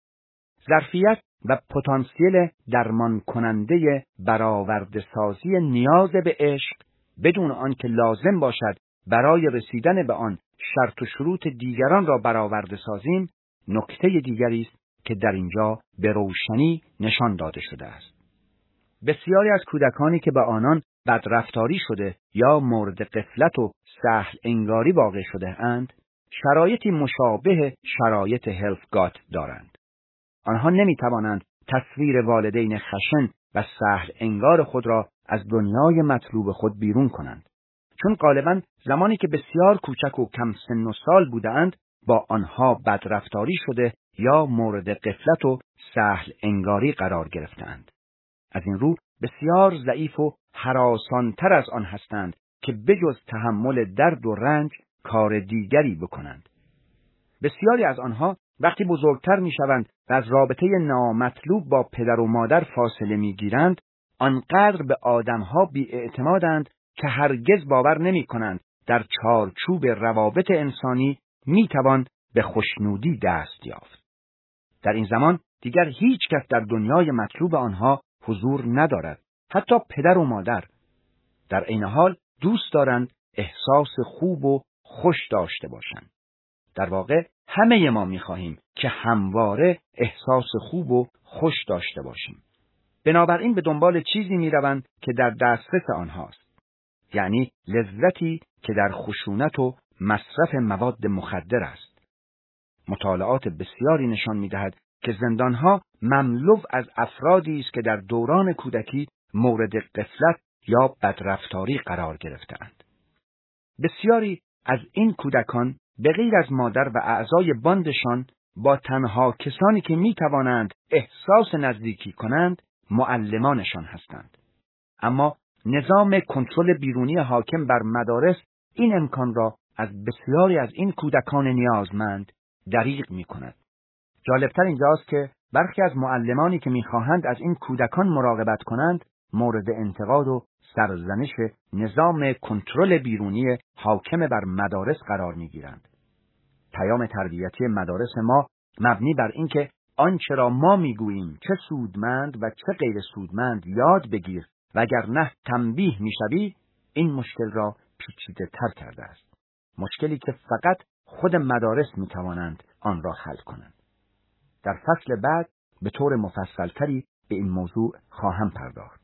ظرفیت و پتانسیل درمان کننده برآورده سازی نیاز به عشق بدون آنکه لازم باشد برای رسیدن به آن شرط و شروط دیگران را برآورده سازیم، نکته دیگری است که در اینجا به روشنی نشان داده شده است. بسیاری از کودکانی که به آنان بدرفتاری شده یا مورد غفلت و سهل انگاری واقع شده اند، شرایطی مشابه شرایط هلفگات دارند. آنها نمی توانند تصویر والدین خشن و سهل انگار خود را از دنیای مطلوب خود بیرون کنند، چون غالباً زمانی که بسیار کوچک و کم سن و سال بودند با آنها بدرفتاری شده یا مورد غفلت و سهل انگاری قرار گرفتند. از این رو بسیار ضعیف و هراسان‌تر از آن هستند که بجز تحمل درد و رنج کار دیگری بکنند. بسیاری از آنها وقتی بزرگتر میشوند و از رابطه نامطلوب با پدر و مادر فاصله میگیرند، آنقدر به آدمها بی‌اعتمادند که هرگز باور نمی‌کنند در چارچوب روابط انسانی میتوان به خوشنودی دست یافت. در این زمان دیگر هیچ کس در دنیای مطلوب آنها حضور ندارد، حتی پدر و مادر. در عین حال دوست دارند احساس خوب و خوش داشته باشند. در واقع همه ما می‌خواهیم که همواره احساس خوب و خوش داشته باشیم. بنابراین به دنبال چیزی می‌روند که در دسترس آنهاست، یعنی لذتی که در خشونت و مصرف مواد مخدر است. مطالعات بسیاری نشان می‌دهد که زندان‌ها مملو از افرادی است که در دوران کودکی مورد غفلت یا بدرفتاری قرار گرفته‌اند. بسیاری از این کودکان به غیر از مادر و اعضای باندشان با تنها کسانی که می‌توانند احساس نزدیکی کنند معلمانشان هستند. اما نظام کنترل بیرونی حاکم بر مدارس این امکان را از بسیاری از این کودکان نیازمند دریغ می‌کند. جالبتر اینجاست که برخی از معلمانی که می‌خواهند از این کودکان مراقبت کنند مورد انتقاد و سرزنش نظام کنترل بیرونی حاکم بر مدارس قرار می‌گیرند. پیام تربیتی مدارس ما مبنی بر اینکه آنچه را ما می‌گوییم چه سودمند و چه غیر سودمند یاد بگیر و اگر نه تنبیه می‌شوی، این مشکل را پیچیده‌تر کرده است. مشکلی که فقط خود مدارس می‌توانند آن را حل کنند. در فصل بعد به طور مفصل‌تری به این موضوع خواهم پرداخت.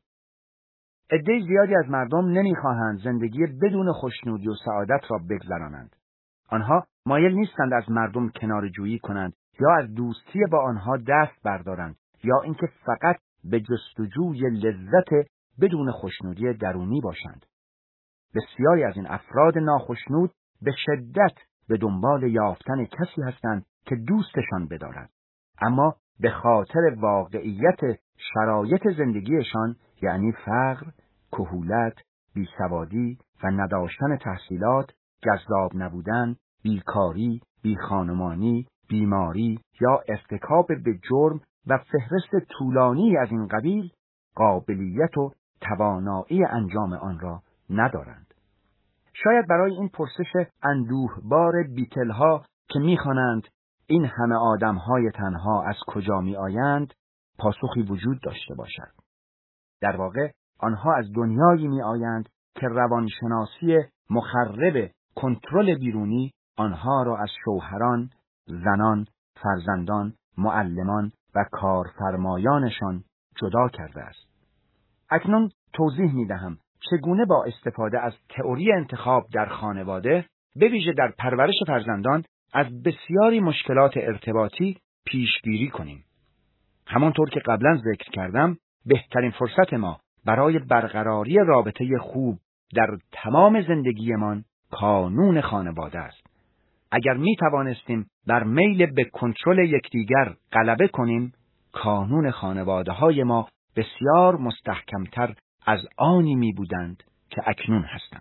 عده زیادی از مردم نمی‌خواهند زندگی بدون خوشنودی و سعادت را بگذرانند. آنها مایل نیستند از مردم کناره‌جویی کنند یا از دوستی با آنها دست بردارند یا اینکه فقط به جستجوی لذت بدون خوشنودی درونی باشند. بسیاری از این افراد ناخشنود به شدت به دنبال یافتن کسی هستند که دوستشان بدارد، اما به خاطر واقعیت شرایط زندگیشان، یعنی فقر، کهولت، بیسوادی و نداشتن تحصیلات، جذاب نبودن، بیکاری، بیخانمانی، بیماری یا ارتکاب به جرم و فهرست طولانی از این قبیل، قابلیت و توانایی انجام آن را ندارند. شاید برای این پرسش اندوهبار بیتلها که می‌خوانند این همه آدم‌های تنها از کجا می‌آیند پاسخی وجود داشته باشد. در واقع آنها از دنیایی می‌آیند که روانشناسی مخرب کنترل بیرونی آنها را از شوهران، زنان، فرزندان، معلمان و کارفرمایانشان جدا کرده است. اکنون توضیح می‌دهم چگونه با استفاده از تئوری انتخاب در خانواده، به ویژه در پرورش فرزندان، از بسیاری مشکلات ارتباطی پیشگیری کنیم. همانطور که قبلا ذکر کردم، بهترین فرصت ما برای برقراری رابطه خوب در تمام زندگیمان کانون خانواده است. اگر می توانستیم بر میل به کنترل یکدیگر غلبه کنیم، کانون خانواده های ما بسیار مستحکمتر از آنی می بودند که اکنون هستند.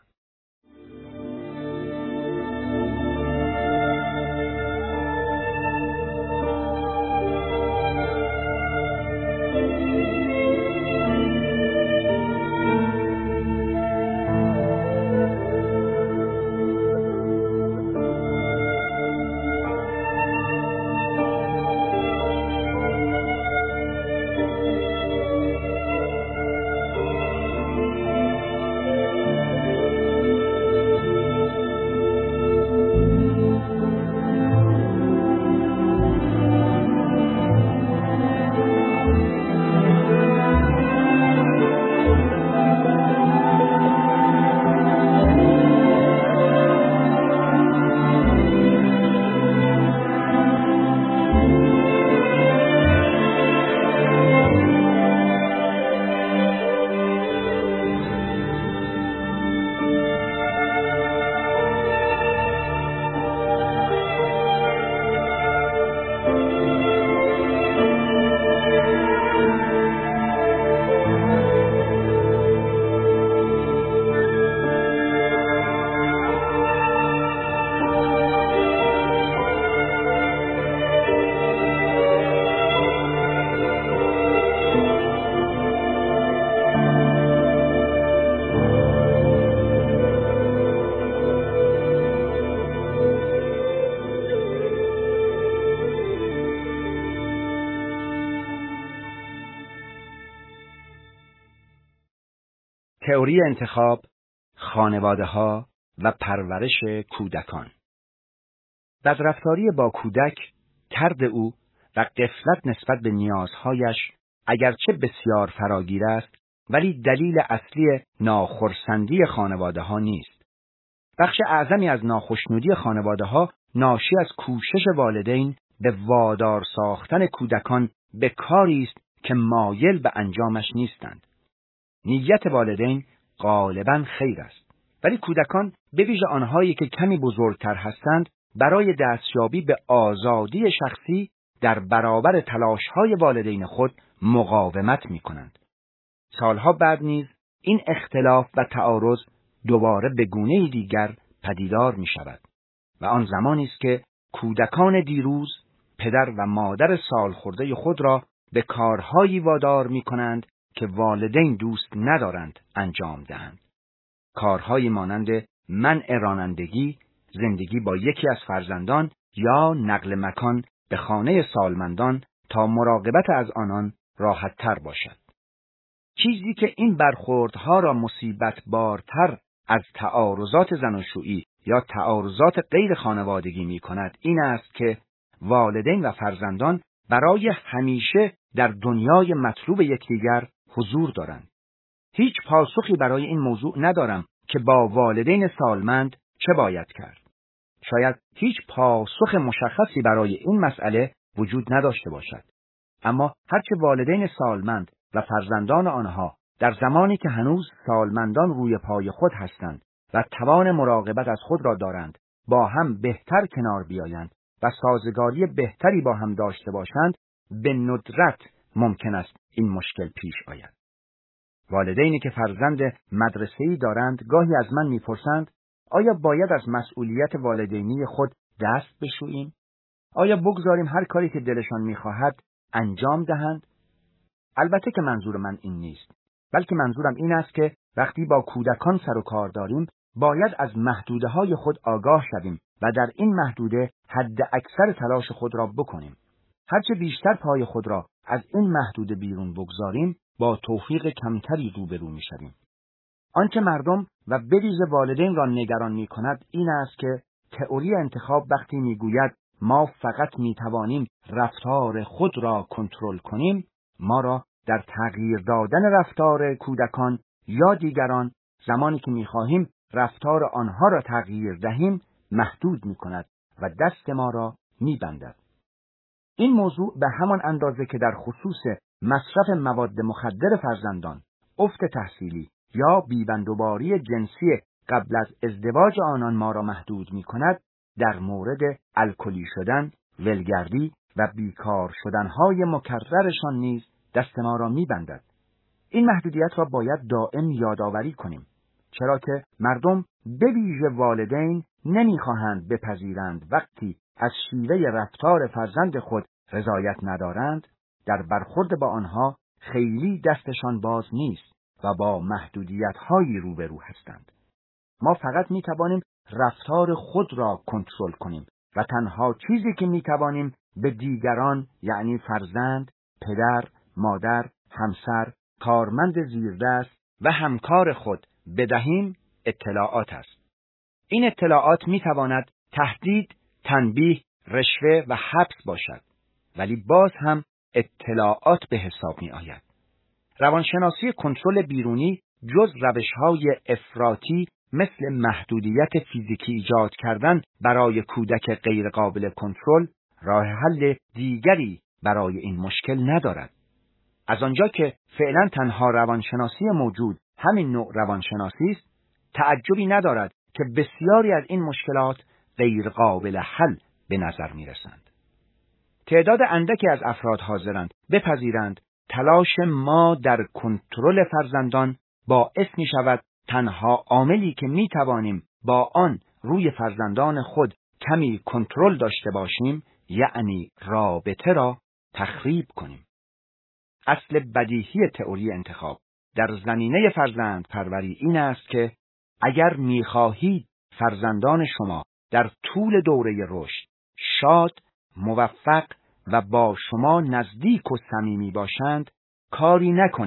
تئوری انتخاب، خانواده‌ها و پرورش کودکان. بدرفتاری با کودک، طرد او و غفلت نسبت به نیازهایش اگرچه بسیار فراگیر است، ولی دلیل اصلی ناخرسندی خانواده‌ها نیست. بخش اعظمی از ناخشنودی خانواده‌ها ناشی از کوشش والدین به وادار ساختن کودکان به کاری است که مایل به انجامش نیستند. نیت والدین غالباً خیر است، ولی کودکان به ویژه آنهایی که کمی بزرگتر هستند برای دستیابی به آزادی شخصی در برابر تلاش‌های والدین خود مقاومت می‌کنند. سالها بعد نیز این اختلاف و تعارض دوباره به گونه‌ای دیگر پدیدار می‌شود و آن زمانی است که کودکان دیروز پدر و مادر سالخورده خود را به کارهایی وادار می‌کنند که والدین دوست ندارند انجام دهند. کارهایی مانند منع رانندگی، زندگی با یکی از فرزندان یا نقل مکان به خانه سالمندان تا مراقبت از آنان راحت تر باشد. چیزی که این برخوردها را مصیبت بارتر از تعارضات زناشویی یا تعارضات غیر خانوادگی می کند این است که والدین و فرزندان برای همیشه در دنیای مطلوب یکدیگر حضور دارند. هیچ پاسخی برای این موضوع ندارم که با والدین سالمند چه باید کرد. شاید هیچ پاسخ مشخصی برای این مسئله وجود نداشته باشد. اما هرچه والدین سالمند و فرزندان آنها در زمانی که هنوز سالمندان روی پای خود هستند و توان مراقبت از خود را دارند با هم بهتر کنار بیایند و سازگاری بهتری با هم داشته باشند، به ندرت ممکن است این مشکل پیش آید. والدینی که فرزند مدرسه‌ای دارند گاهی از من می‌پرسند آیا باید از مسئولیت والدینی خود دست بشوییم؟ آیا بگذاریم هر کاری که دلشان می‌خواهد انجام دهند؟ البته که منظور من این نیست، بلکه منظورم این است که وقتی با کودکان سر و کار داریم باید از محدوده‌های خود آگاه شویم و در این محدوده حد اکثر تلاش خود را بکنیم. هرچه بیشتر پای خود را از این محدوده بیرون بگذاریم با توفیق کمتری روبرو می‌شویم. آنچه مردم و به ویژه والدین را نگران می‌کند این است که تئوری انتخاب وقتی می‌گوید ما فقط می‌توانیم رفتار خود را کنترل کنیم، ما را در تغییر دادن رفتار کودکان یا دیگران زمانی که می‌خواهیم رفتار آنها را تغییر دهیم محدود می‌کند و دست ما را می‌بندد. این موضوع به همان اندازه که در خصوص مصرف مواد مخدر فرزندان، افت تحصیلی یا بیبندوباری جنسی قبل از ازدواج آنان ما را محدود می‌کند، در مورد الکلی شدن، ولگردی و بیکار شدنهای مکررشان نیز دست ما را می‌بندد. این محدودیت را باید دائم یادآوری کنیم، چرا که مردم به ویژه والدین نمی‌خواهند بپذیرند وقتی از شیوه رفتار فرزند خود رضایت ندارند، در برخورد با آنها خیلی دستشان باز نیست و با محدودیت‌هایی روبرو هستند. ما فقط می‌توانیم رفتار خود را کنترل کنیم و تنها چیزی که می‌توانیم به دیگران یعنی فرزند، پدر، مادر، همسر، کارمند زیردست و همکار خود بدهیم اطلاعات است. این اطلاعات می‌تواند تهدید، تنبیه، رشوه و حبس باشد، ولی باز هم اطلاعات به حساب می آید. روانشناسی کنترل بیرونی جز روش‌های افراطی مثل محدودیت فیزیکی ایجاد کردن برای کودک غیر قابل کنترل راه حل دیگری برای این مشکل ندارد. از آنجا که فعلا تنها روانشناسی موجود همین نوع روانشناسی است، تعجبی ندارد که بسیاری از این مشکلات غیر قابل حل به نظر می رسند. تعداد اندکی از افراد حاضرند بپذیرند تلاش ما در کنترل فرزندان باعث می شود تنها عاملی که می توانیم با آن روی فرزندان خود کمی کنترل داشته باشیم یعنی رابطه را تخریب کنیم. اصل بدیهی تئوری انتخاب در زمینه فرزند پروری این است که اگر می خواهید فرزندان شما در طول دوره رشد شاد، موفق و با شما نزدیک و صمیمی باشند، کاری نکنید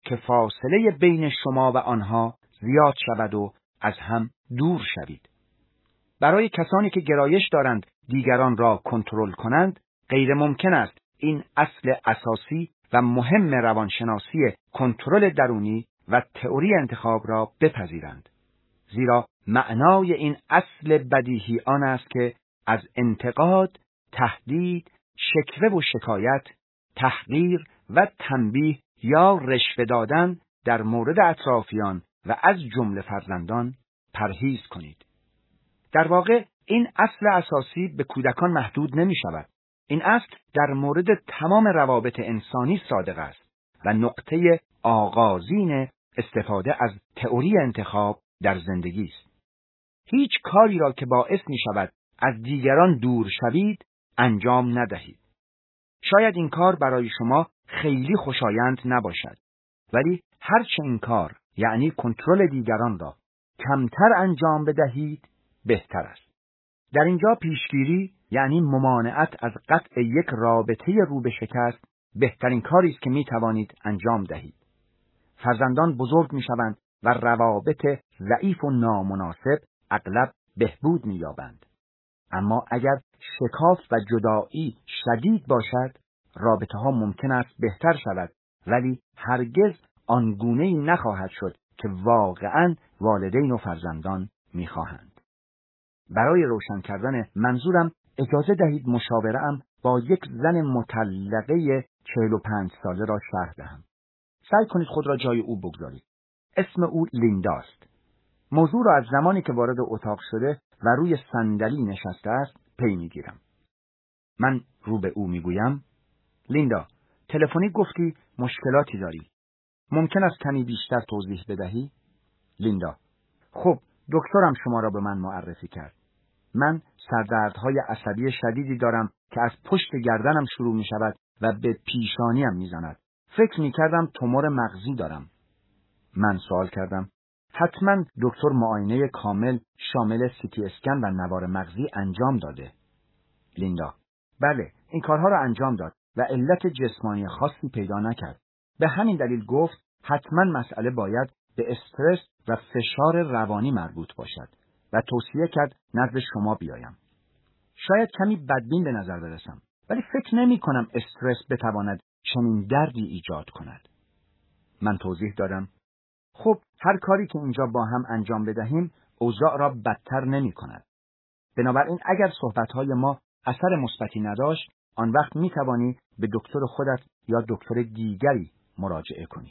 که فاصله بین شما و آنها زیاد شود و از هم دور شوید. برای کسانی که گرایش دارند دیگران را کنترل کنند، غیر ممکن است این اصل اساسی و مهم روانشناسی کنترل درونی و تئوری انتخاب را بپذیرند. زیرا معنای این اصل بدیهی آن است که از انتقاد، تهدید، شکوه و شکایت، تحقیر و تنبیه یا رشوه دادن در مورد اطرافیان و از جمله فرزندان پرهیز کنید. در واقع این اصل اساسی به کودکان محدود نمی شود. این اصل در مورد تمام روابط انسانی صادق است و نقطه آغازین استفاده از تئوری انتخاب در زندگی است. هیچ کاری را که باعث می شود از دیگران دور شوید انجام ندهید. شاید این کار برای شما خیلی خوشایند نباشد، ولی هرچه این کار یعنی کنترل دیگران را کمتر انجام بدهید بهتر است. در اینجا پیشگیری یعنی ممانعت از قطع یک رابطه رو به شکست بهترین کاری است که می توانید انجام دهید. فرزندان بزرگ می شوند و روابط ضعیف و نامناسب اغلب بهبود می یابند. اما اگر شکاف و جدایی شدید باشد، رابطه ها ممکن است بهتر شود، ولی هرگز آنگونه‌ای نخواهد شد که واقعاً والدین و فرزندان می خواهند. برای روشن کردن منظورم اجازه دهید مشاوره‌ام با یک زن مطلقه چهل و پنج ساله را شرح دهم. سعی کنید خود را جای او بگذارید. اسم او لیندا است. موضوع را از زمانی که وارد اتاق شده و روی صندلی نشسته است پی میگیرم. من رو به او میگویم: لیندا، تلفنی گفتی مشکلاتی داری. ممکن است کمی بیشتر توضیح بدهی؟ لیندا: خب، دکترم شما را به من معرفی کرد. من سردردهای عصبی شدیدی دارم که از پشت گردنم شروع می شود و به پیشانیم می زند. فکر می کردم تومور مغزی دارم. من سوال کردم: حتما دکتر معاینه کامل شامل سی تی اسکن و نوار مغزی انجام داده. لیندا: بله، این کارها را انجام داد و علت جسمانی خاصی پیدا نکرد. به همین دلیل گفت حتما مسئله باید به استرس و فشار روانی مربوط باشد و توصیه کرد نزد شما بیایم. شاید کمی بدبین به نظر برسم، ولی فکر نمی کنم استرس بتواند چنین دردی ایجاد کند. من توضیح دادم: خب، هر کاری که اینجا با هم انجام بدهیم اوضاع را بدتر نمی کند. بنابراین اگر صحبتهای ما اثر مثبتی نداشت، آن وقت می توانی به دکتر خودت یا دکتر دیگری مراجعه کنی.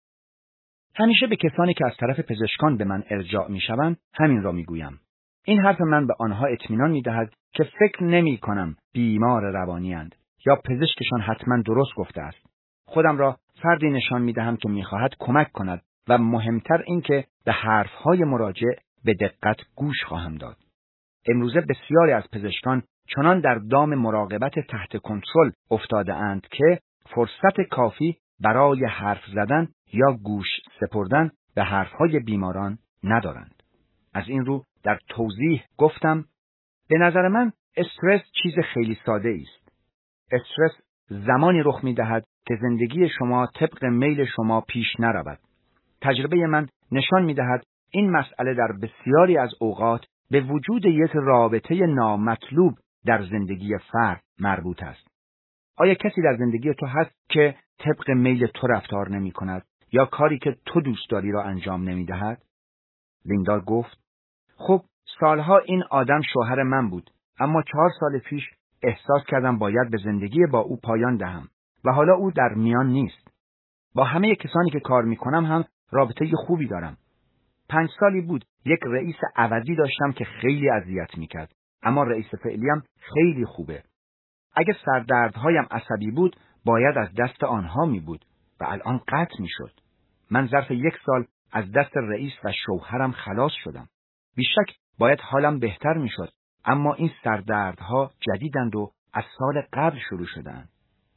همیشه به کسانی که از طرف پزشکان به من ارجاع می شوند همین را می گویم. این حرف من به آنها اطمینان می دهد که فکر نمی کنم بیمار روانی اند یا پزشکشان حتما درست گفته است. خودم را فردی نشان می دهم که می خواهد کمک کند و مهمتر این که به حرفهای مراجع به دقت گوش خواهم داد. امروزه بسیاری از پزشکان چنان در دام مراقبت تحت کنترل افتاده اند که فرصت کافی برای حرف زدن یا گوش سپردن به حرفهای بیماران ندارند. از این رو در توضیح گفتم: به نظر من استرس چیز خیلی ساده است. استرس زمانی رخ می دهد که زندگی شما طبق میل شما پیش نرود. تجربه من نشان می دهد این مسئله در بسیاری از اوقات به وجود یک رابطه نامطلوب در زندگی فرد مربوط است. آیا کسی در زندگی تو هست که طبق میل تو رفتار نمی کند یا کاری که تو دوست داری را انجام نمی دهد؟ لیندا گفت: خب، سالها این آدم شوهر من بود، اما چهار سال پیش احساس کردم باید به زندگی با او پایان دهم و حالا او در میان نیست. با همه کسانی که کار می کنم هم رابطه خوبی دارم. پنج سالی بود یک رئیس عوضی داشتم که خیلی اذیت می کرد، اما رئیس فعلیم خیلی خوبه. اگه سردردهایم عصبی بود باید از دست آنها می بود و الان قطع می شد. من ظرف یک سال از دست رئیس و شوهرم خلاص شدم. بیشک باید حالم بهتر می شد، اما این سردردها جدیدند و از سال قبل شروع شدند.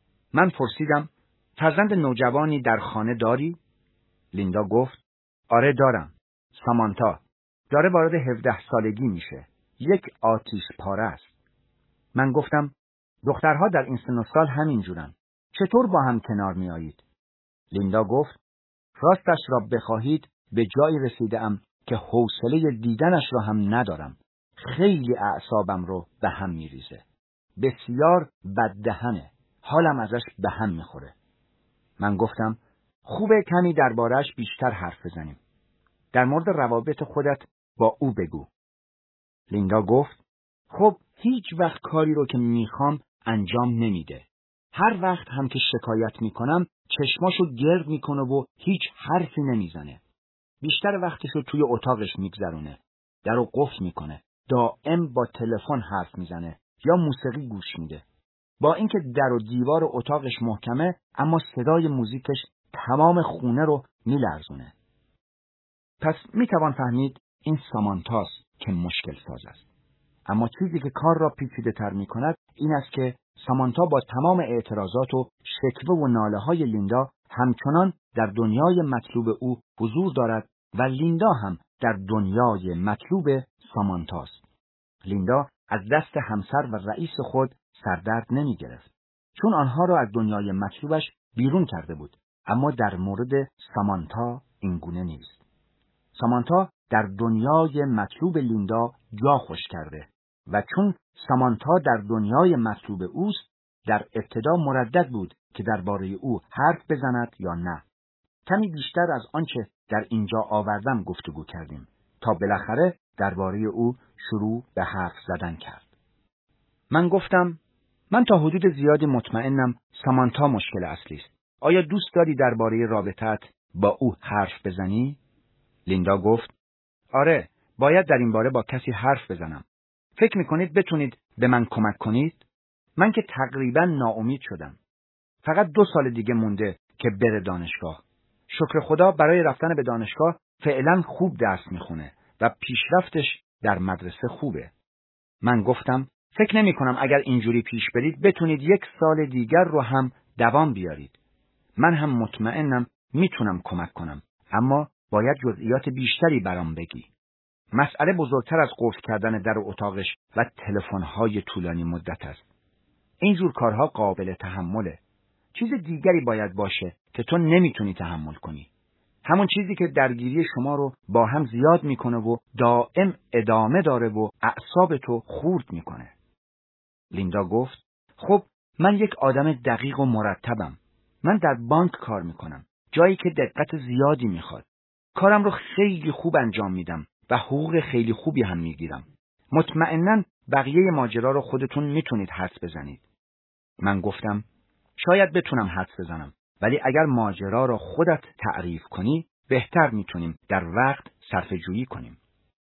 من پرسیدم: فرزند نوجوانی در خانه داری؟ لیندا گفت: آره دارم. سامانتا داره وارد هفده سالگی میشه. یک آتیش پاره است. من گفتم: دخترها در این سن و سال همین جورن. چطور با هم کنار می آیید؟ لیندا گفت: راستش را بخواهید به جای رسیدم که حوصله دیدنش را هم ندارم. خیلی اعصابم رو به هم میریزه. بسیار بددهنه. حالم ازش به هم میخوره. من گفتم خوبه کمی درباره‌اش بیشتر حرف بزنیم. در مورد روابط خودت با او بگو. لیندا گفت خب هیچ وقت کاری رو که میخوام انجام نمیده. هر وقت هم که شکایت میکنم چشماشو گرد میکنه و هیچ حرفی نمیزنه. بیشتر وقتشو توی اتاقش میگذرونه. درو قفل میکنه. دائم با تلفن حرف میزنه یا موسیقی گوش میده. با اینکه در و دیوار اتاقش محکمه اما صدای موزیکش تمام خونه رو میلرزونه. پس میتوان فهمید این سامانتاست که مشکل ساز است. اما چیزی که کار را پیچیده تر می کند این است که سامانتا با تمام اعتراضات و شکوه و ناله های لیندا همچنان در دنیای مطلوب او حضور دارد و لیندا هم در دنیای مطلوب سامانتاست. لیندا از دست همسر و رئیس خود سردرد نمی گرفت، چون آنها را از دنیای مطلوبش بیرون کرده بود. اما در مورد سامانتا این گونه نیست. سامانتا در دنیای مطلوب لیندا جا خوش کرده و چون سامانتا در دنیای مطلوب اوست، در ابتدا مردد بود که درباره او حرف بزند یا نه. کمی بیشتر از آنچه در اینجا آوردم گفتگو کردیم تا بالاخره درباره او شروع به حرف زدن کرد. من گفتم من تا حدود زیادی مطمئنم سامانتا مشکل اصلی است. آیا دوست داری درباره رابطت با او حرف بزنی؟ لیندا گفت آره، باید در این باره با کسی حرف بزنم. فکر میکنید بتونید به من کمک کنید؟ من که تقریبا ناامید شدم. فقط دو سال دیگه مونده که بره دانشگاه. شکر خدا برای رفتن به دانشگاه فعلا خوب درس میخونه و پیشرفتش در مدرسه خوبه. من گفتم فکر نمی کنم اگر اینجوری پیش برید بتونید یک سال دیگر رو هم دوام بیارید. من هم مطمئنم میتونم کمک کنم، اما باید جزئیات بیشتری برام بگی. مسئله بزرگتر از قفل کردن در اتاقش و تلفن‌های طولانی مدت است. این جور کارها قابل تحمله. چیز دیگری باید باشه که تو نمیتونی تحمل کنی. همون چیزی که درگیری شما رو با هم زیاد میکنه و دائم ادامه داره و اعصاب تو خورد میکنه. لیندا گفت خب من یک آدم دقیق و مرتبم. من در بانک کار میکنم، جایی که دقت زیادی میخواد. کارم رو خیلی خوب انجام میدم و حقوق خیلی خوبی هم میگیرم. مطمئناً بقیه ماجرا رو خودتون میتونید حدس بزنید. من گفتم شاید بتونم حدس بزنم، ولی اگر ماجرا را خودت تعریف کنی بهتر میتونیم در وقت صرفه جویی کنیم.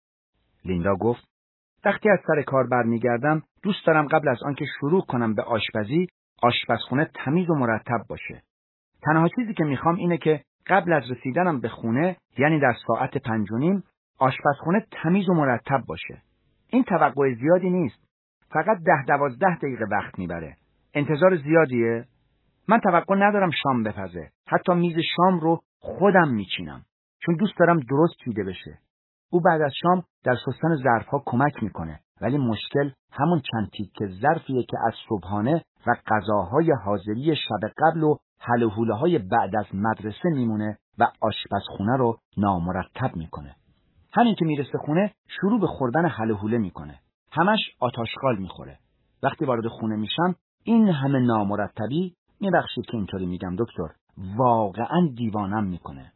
لیندا گفت وقتی از سر کار برمیگردم دوست دارم قبل از آنکه شروع کنم به آشپزی آشپزخونه تمیز و مرتب باشه. تنها چیزی که میخوام اینه که قبل از رسیدنم به خونه، یعنی در ساعت پنج و نیم، آشپزخونه تمیز و مرتب باشه. این توقع زیادی نیست. فقط ده دوازده دقیقه وقت میبره. انتظار زیادیه؟ من توقع ندارم شام بپزه. حتی میز شام رو خودم میچینم. چون دوست دارم درست چیده بشه. او بعد از شام در شستن ظرفها کمک میکنه. ولی مشکل همون چند تیکه ظرفیه که از صبحانه و غذاهای حاضری شب قبل و حل و حوله های بعد از مدرسه میمونه و آشپزخونه رو نامرتب میکنه. همین که میرسه خونه شروع به خوردن حل و حوله میکنه. همش آتاشقال میخوره. وقتی وارد خونه میشم این همه نامرتبی، میبخشید که اینطوری میگم دکتر، واقعا دیوانم میکنه.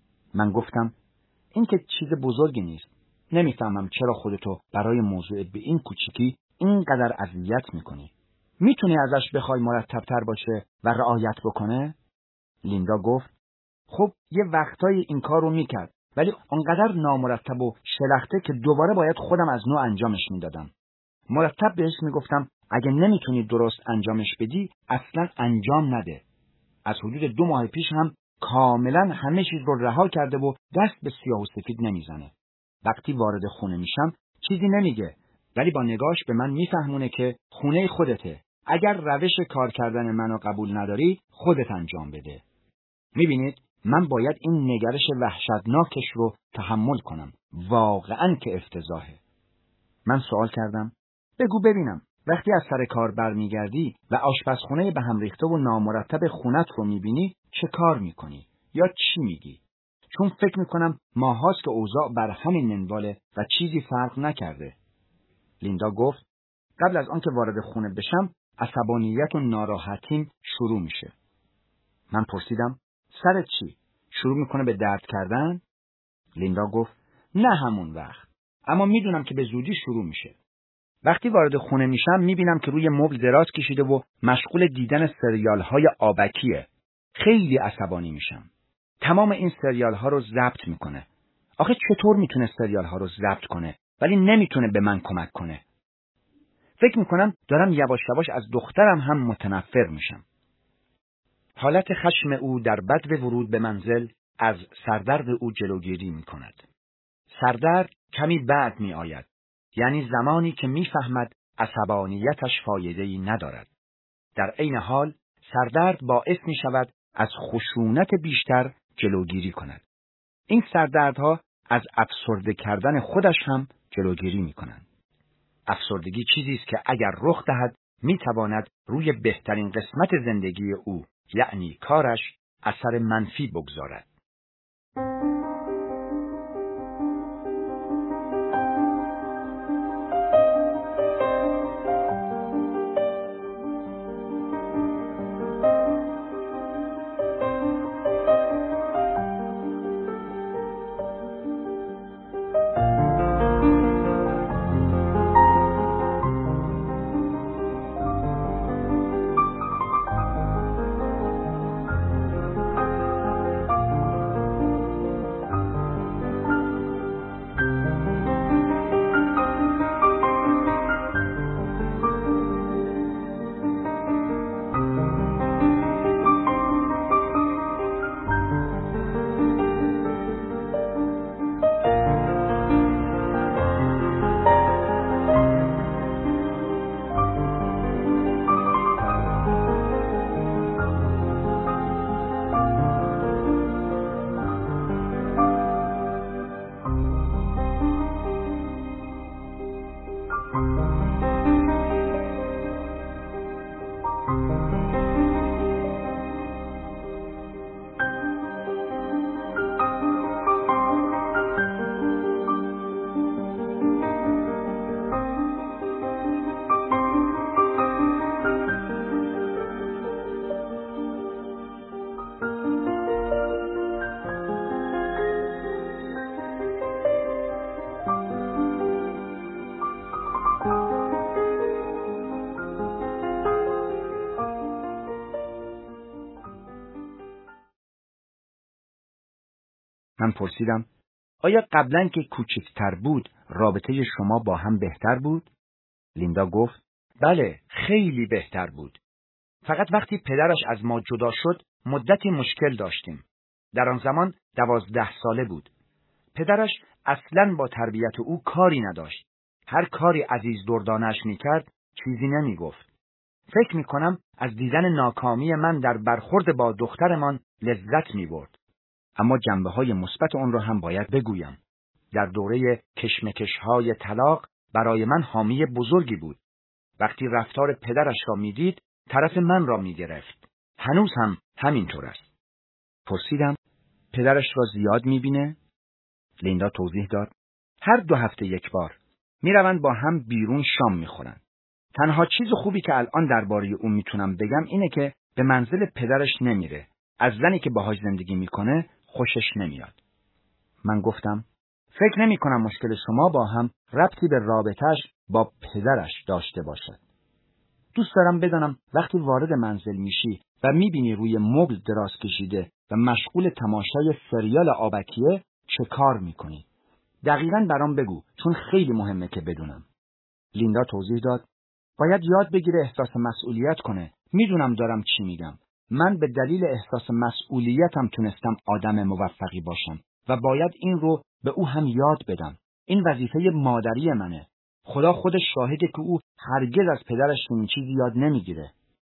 من گفتم این که چیز بزرگی نیست. نمیفهمم چرا خودتو برای موضوع به این کوچیکی اینقدر اذیت میکنی. میتونی ازش بخوای مرتب‌تر باشه و رعایت بکنه؟ لیندا گفت خب یه وقتایی این کار رو میکرد، ولی انقدر نامرتب و شلخته که دوباره باید خودم از نوع انجامش میدادم. مرتب بهش میگفتم اگه نمیتونی درست انجامش بدی اصلا انجام نده. از حدود دو ماه پیش هم کاملا همه چیز رو رها کرده و دست به سیاه و سفید نمیزنه. وقتی وارد خونه میشم چیزی نمیگه، ولی با نگاش به من میفهمونه که خونه خودته. اگر روش کار کردن منو قبول نداری خودت انجام بده. میبینید من باید این نگرش وحشتناکش رو تحمل کنم. واقعاً که افتضاحه. من سوال کردم بگو ببینم وقتی از سر کار برمیگردی و آشپزخونه به هم ریخته و نامرتب خونت رو میبینی چه کار میکنی؟ یا چی میگی؟ چون فکر میکنم ماهاست که اوضاع بر همین منواله و چیزی فرق نکرده. لیندا گفت قبل از آنکه وارد خونه بشم عصبانیت و ناراحتیم شروع میشه. من پرسیدم سرت چی؟ شروع میکنه به درد کردن؟ لیندا گفت نه همون وقت، اما میدونم که به زودی شروع میشه. وقتی وارد خونه میشم میبینم که روی مبل دراز کشیده و مشغول دیدن سریال های آبکیه. خیلی عصبانی میشم. تمام این سریال ها رو ضبط میکنه. آخه چطور میتونه سریال ها رو ضبط کنه ولی نمیتونه به من کمک کنه؟ فکر میکنم دارم یواش یواش از دخترم هم متنفر میشم. حالت خشم او در بدو ورود به منزل از سردرد او جلوگیری میکند. سردرد کمی بعد می آید. یعنی زمانی که میفهمد عصبانیتش فایده‌ای ندارد. در عین حال سردرد باعث می شود از خشونت بیشتر جلوگیری کند. این سردردها از افسرده کردن خودش هم جلوگیری می کنند. افسردگی چیزی است که اگر رخ دهد می تواند روی بهترین قسمت زندگی او، یعنی کارش، اثر منفی بگذارد. من پرسیدم آیا قبلا که کوچکتر بود رابطه شما با هم بهتر بود؟ لیندا گفت بله، خیلی بهتر بود. فقط وقتی پدرش از ما جدا شد مدتی مشکل داشتیم. در آن زمان دوازده ساله بود. پدرش اصلاً با تربیت او کاری نداشت. هر کاری عزیز دردانش میکرد چیزی نمیگفت. فکر میکنم از دیدن ناکامی من در برخورد با دخترمان لذت میبرد. اما جنبه‌های مثبت آن را هم باید بگویم. در دوره کشمکش‌های طلاق برای من حامی بزرگی بود. وقتی رفتار پدرش را میدید، طرف من را میگرفت. هنوز هم همینطور است. پرسیدم پدرش را زیاد میبینه؟ لیندا توضیح داد هر دو هفته یک بار میروند با هم بیرون شام میخورن. تنها چیز خوبی که الان درباره او میتونم بگم اینه که به منزل پدرش نمیره. از زنی که باهاش زندگی میکنه خوشش نمیاد. من گفتم فکر نمی کنم مشکل شما با هم ربطی به رابطش با پدرش داشته باشد. دوست دارم بدانم وقتی وارد منزل میشی و میبینی روی مبل دراز کشیده و مشغول تماشای سریال آبکیه چه کار میکنی؟ دقیقاً برام بگو، چون خیلی مهمه که بدونم. لیندا توضیح داد باید یاد بگیره احساس مسئولیت کنه. میدونم دارم چی میگم. من به دلیل احساس مسئولیتم تونستم آدم موفقی باشم و باید این رو به او هم یاد بدم. این وظیفه مادری منه. خدا خودش شاهده که او هرگز از پدرش این چیزی یاد نمیگیره.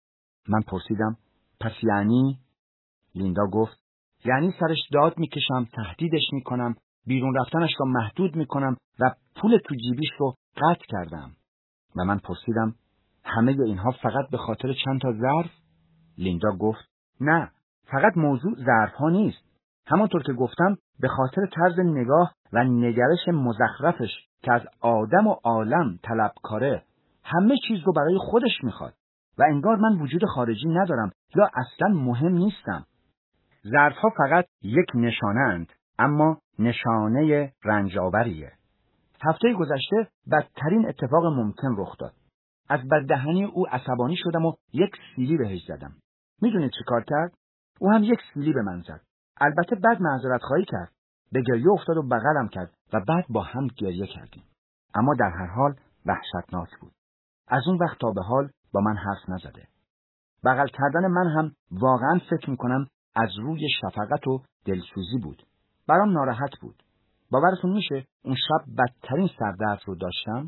من پرسیدم پس یعنی؟ لیندا گفت یعنی سرش داد میکشم، تهدیدش میکنم، بیرون رفتنش رو محدود میکنم و پول تو جیبیش رو قطع کردم. و من پرسیدم همه اینها فقط به خاطر چند تا ظرف؟ لیندا گفت نه، فقط موضوع ظرف ها نیست. همانطور که گفتم به خاطر طرز نگاه و نگرش مزخرفش که از آدم و عالم طلبکاره، همه چیز رو برای خودش میخواد و انگار من وجود خارجی ندارم یا اصلا مهم نیستم. ظرفها فقط یک نشانه‌اند، اما نشانه رنج‌آوریه. هفته گذشته بدترین اتفاق ممکن رخ داد. از بددهنی او عصبانی شدم و یک سیلی بهش زدم. میدونید چه کار کرد؟ او هم یک سیلی به من زد. البته بعد معذرت خواهی کرد. به گریه افتاد و بغلم کرد و بعد با هم گریه کردیم. اما در هر حال وحشتناک بود. از اون وقت تا به حال با من حرف نزده. بغل کردن من هم واقعا فکر میکنم از روی شفقت و دلسوزی بود. برام ناراحت بود. باورتون میشه اون شب بدترین سردرد رو داشتم؟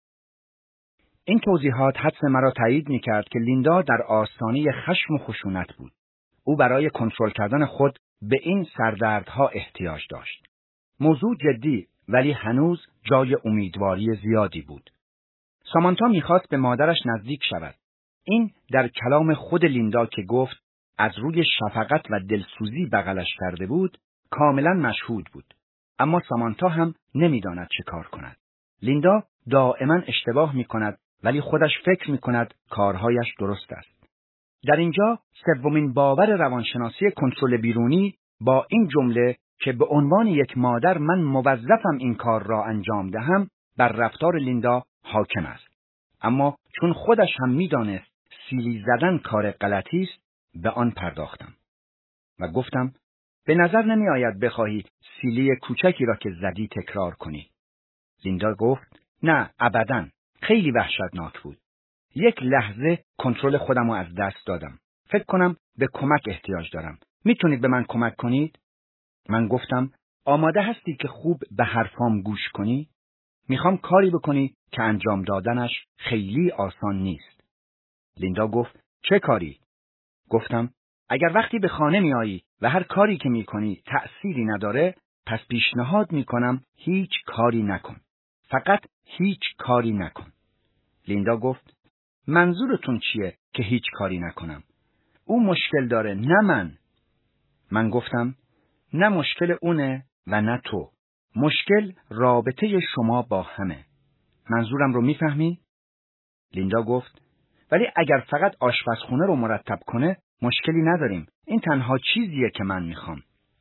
این توضیحات حدس مرا تایید میکرد که لیندا در آستانه خشم و خشونت بود. او برای کنترل کردن خود به این سردردها احتیاج داشت. موضوع جدی ولی هنوز جای امیدواری زیادی بود. سامانتا میخواست به مادرش نزدیک شود. این در کلام خود لیندا که گفت از روی شفقت و دلسوزی بغلش کرده بود، کاملا مشهود بود. اما سامانتا هم نمیداند چه کار کند. لیندا دائما اشتباه میکند ولی خودش فکر میکند کارهایش درست است. در اینجا سومین باور روانشناسی کنترل بیرونی با این جمله که به عنوان یک مادر من موظفم این کار را انجام دهم بر رفتار لیندا حاکم است. اما چون خودش هم میدانست سیلی زدن کار غلطی است، به آن پرداختم و گفتم به نظر نمی آید بخواهی سیلی کوچکی را که زدی تکرار کنی. لیندا گفت نه ابداً، خیلی وحشتناک بود. یک لحظه کنترل خودم رو از دست دادم. فکر کنم به کمک احتیاج دارم. میتونید به من کمک کنید؟ من گفتم آماده هستی که خوب به حرفام گوش کنی؟ میخوام کاری بکنی که انجام دادنش خیلی آسان نیست. لیندا گفت چه کاری؟ گفتم اگر وقتی به خانه میایی و هر کاری که میکنی تأثیری نداره، پس پیشنهاد میکنم هیچ کاری نکن. فقط هیچ کاری نکن. لیندا گفت منظورتون چیه که هیچ کاری نکنم؟ او مشکل داره نه من. من گفتم نه مشکل اونه و نه تو. مشکل رابطه شما با همه. منظورم رو میفهمی؟ لیندا گفت ولی اگر فقط آشپزخونه رو مرتب کنه مشکلی نداریم. این تنها چیزیه که من میخوام.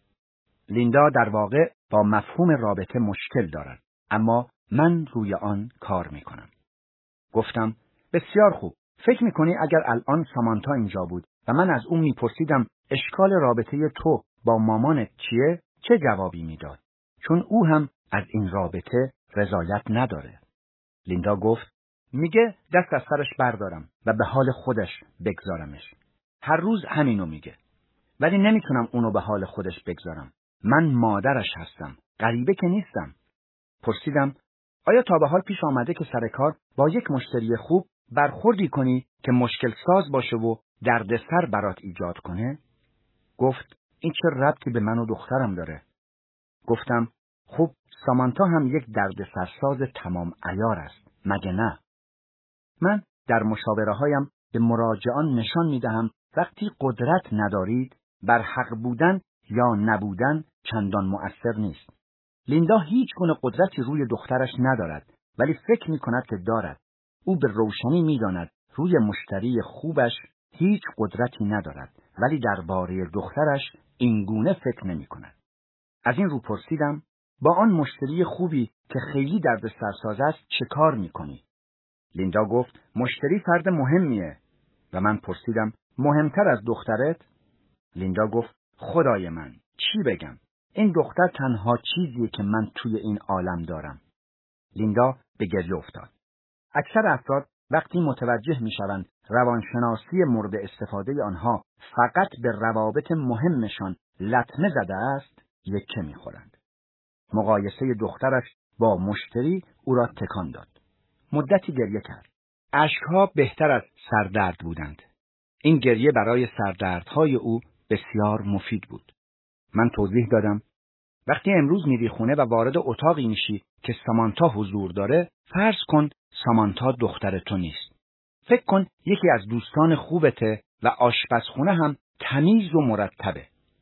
لیندا در واقع با مفهوم رابطه مشکل دارد، اما من روی آن کار میکنم. گفتم بسیار خوب. فکر میکنی اگر الان سامانتا اینجا بود و من از اون میپرسیدم اشکال رابطه تو با مامانت چیه، چه جوابی میداد؟ چون او هم از این رابطه رضایت نداره. لیندا گفت میگه دست از سرش بردارم و به حال خودش بگذارمش. هر روز همینو میگه. ولی نمیتونم اونو به حال خودش بگذارم. من مادرش هستم. غریبه که نیستم. پرسیدم آیا تا به حال پیش آمده که سر کار با یک مشتری خوب برخوردی کنی که مشکل ساز باشه و دردسر برات ایجاد کنه؟ گفت این چه ربطی به من و دخترم داره؟ گفتم خب سامانتا هم یک دردسرساز تمام عیار است، مگه نه؟ من در مشاوره هایم به مراجعان نشان می دهم وقتی قدرت ندارید، بر حق بودن یا نبودن چندان مؤثر نیست. لیندا هیچ گونه قدرتی روی دخترش ندارد، ولی فکر می کند که دارد. او به روشنی می داند روی مشتری خوبش هیچ قدرتی ندارد، ولی درباره دخترش این گونه فکر نمی کند. از این رو پرسیدم با آن مشتری خوبی که خیلی دردسرساز است چه کار می کنی؟ لیندا گفت مشتری فرد مهمیه. و من پرسیدم مهمتر از دخترت؟ لیندا گفت خدای من چی بگم؟ این دختر تنها چیزیه که من توی این عالم دارم. لیندا به گریه افتاد. اکثر افراد وقتی متوجه میشوند روانشناسی مورد استفاده آنها فقط به روابط مهمشان لطمه زده است، یکه میخورند. مقایسه دخترش با مشتری او را تکان داد. مدتی گریه کرد. اشکها بهتر از سردرد بودند. این گریه برای سردردهای او بسیار مفید بود. من توضیح دادم وقتی امروز میری خونه و وارد اتاقی میشی که سامانتا حضور داره، فرض کن سامانتا دختر تو نیست. فکر کن یکی از دوستان خوبته و آشپزخونه هم تمیز و مرتبه.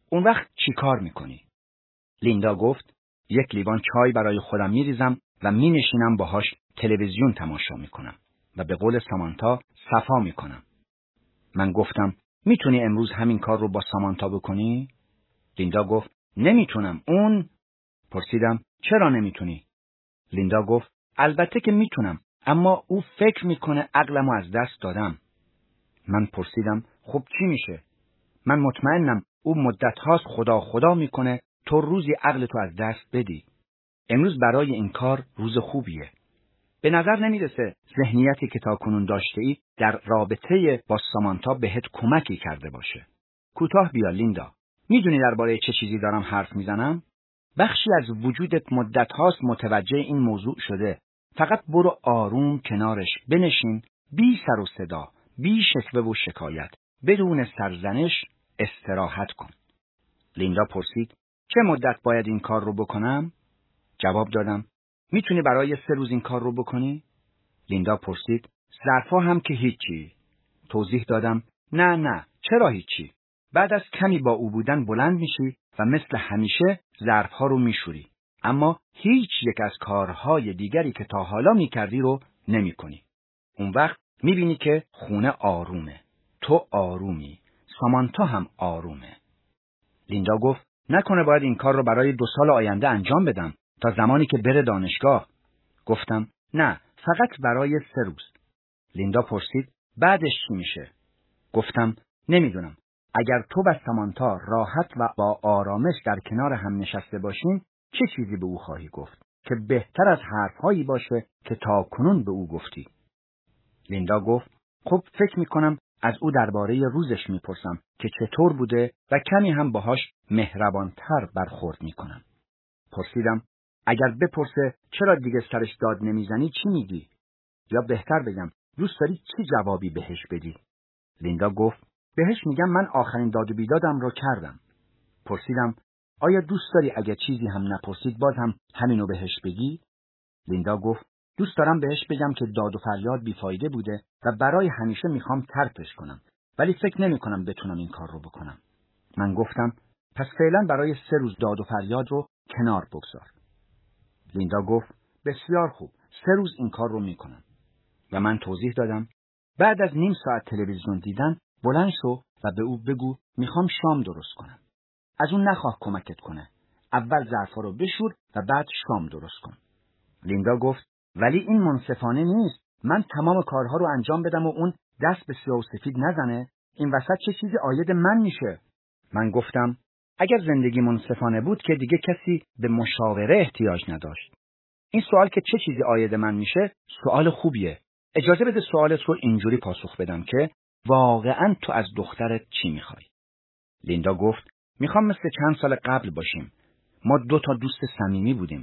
اون وقت چی کار میکنی؟ لیندا گفت یک لیوان چای برای خودم میریزم و مینشینم باهاش تلویزیون تماشا میکنم و به قول سامانتا صفا میکنم. من گفتم میتونی امروز همین کار رو با سامانتا بکنی؟ لیندا گفت نمیتونم. اون پرسیدم چرا نمیتونی؟ لیندا گفت البته که میتونم، اما او فکر میکنه عقلمو از دست دادم. من پرسیدم خب چی میشه؟ من مطمئنم او مدت هاست خدا خدا میکنه تو روزی عقلتو از دست بدی. امروز برای این کار روز خوبیه. به نظر نمیرسه ذهنیتی که تا کنون داشته ای در رابطه با سامانتا بهت کمکی کرده باشه. کوتاه بیا لیندا. میدونی درباره چه چیزی دارم حرف میزنم؟ بخشی از وجودت مدت هاست متوجه این موضوع شده. فقط برو آروم کنارش بنشین، بی سر و صدا، بی شکوه و شکایت، بدون سرزنش استراحت کن. لیندا پرسید چه مدت باید این کار رو بکنم؟ جواب دادم میتونی برای سه روز این کار رو بکنی؟ لیندا پرسید ظرفا هم که هیچی. توضیح دادم نه نه چرا هیچی. بعد از کمی با او بودن بلند میشی و مثل همیشه ظرفها رو میشوری، اما هیچ یک از کارهای دیگری که تا حالا میکردی رو نمیکنی. اون وقت میبینی که خونه آرومه، تو آرومی، سامانتا هم آرومه. لیندا گفت نکنه باید این کار رو برای دو سال آینده انجام بدم تا زمانی که بره دانشگاه. گفتم نه، فقط برای سه روز. لیندا پرسید بعدش چی میشه؟ گفتم نمیدونم. اگر تو و سامانتا راحت و با آرامش در کنار هم نشسته باشین، چه چیزی به او خواهی گفت که بهتر از حرفهایی باشه که تا کنون به او گفتی؟ لیندا گفت خب فکر میکنم از او درباره روزش میپرسم که چطور بوده و کمی هم باهاش مهربانتر برخورد میکنم. پرسیدم اگر بپرسه چرا دیگه سرش داد نمیزنی چی میگی؟ یا بهتر بگم دوست داری چی جوابی بهش بدی؟ لیندا گفت بهش میگم من آخرین داد و بیدادم رو کردم. پرسیدم آیا دوست داری اگه چیزی هم نپرسید باز هم همینو بهش بگی؟ لیندا گفت دوست دارم بهش بگم که داد و فریاد بیفایده بوده و برای همیشه میخوام ترکش کنم، ولی فکر نمی کنم بتونم این کار رو بکنم. من گفتم پس فعلا برای سه روز داد و فریاد رو کنار بگذار. لیندا گفت بسیار خوب، سه روز این کار رو میکنم. و من توضیح دادم بعد از نیم ساعت تلویزیون دیدن بلند شو و به او بگو میخوام شام درست کنم. از اون نخواه کمکت کنه. اول ظرفا رو بشور و بعد شام درست کن. لیندا گفت ولی این منصفانه نیست. من تمام کارها رو انجام بدم و اون دست به سیاه و سفید نزنه. این وسط چه چیزی عاید من میشه؟ من گفتم اگر زندگی منصفانه بود که دیگه کسی به مشاوره احتیاج نداشت. این سوال که چه چیزی عاید من میشه سوال خوبیه. اجازه بده سوالت رو اینجوری پاسخ بدم که واقعاً تو از دخترت چی میخوای؟ لیندا گفت میخوام مثل چند سال قبل باشیم. ما دو تا دوست صمیمی بودیم.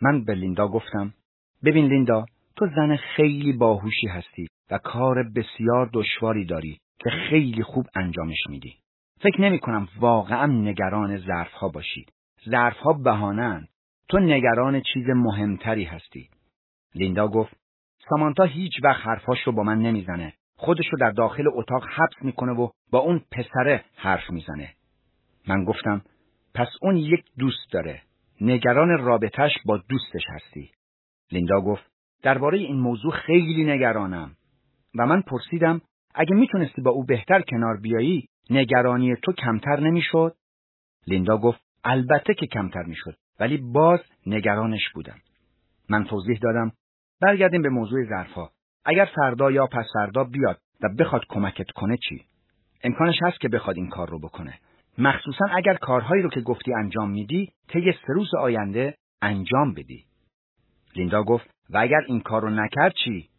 من به لیندا گفتم ببین لیندا، تو زن خیلی باهوشی هستی و کار بسیار دشواری داری که خیلی خوب انجامش میدی. فکر نمی کنم واقعا نگران ظرفها باشی. ظرفها بهانه‌اند. تو نگران چیز مهمتری هستی. لیندا گفت سامانتا هیچ وقت حرفاش رو با من نمیزنه. خودش رو در داخل اتاق حبس میکنه و با اون پسره حرف میزنه. من گفتم پس اون یک دوست داره. نگران رابطش با دوستش هستی. لیندا گفت درباره این موضوع خیلی نگرانم. و من پرسیدم اگه میتونستی با او بهتر کنار بیایی نگرانی تو کمتر نمیشد؟ لیندا گفت البته که کمتر میشد، ولی باز نگرانش بودم. من توضیح دادم برگردیم به موضوع ظرفا. اگر فردا یا پس فردا بیاد و بخواد کمکت کنه چی؟ امکانش هست که بخواد این کار رو بکنه. مخصوصا اگر کارهایی رو که گفتی انجام میدی طی سه روز آینده انجام بدی. لیندا گفت و اگر این کار رو نکرد چی؟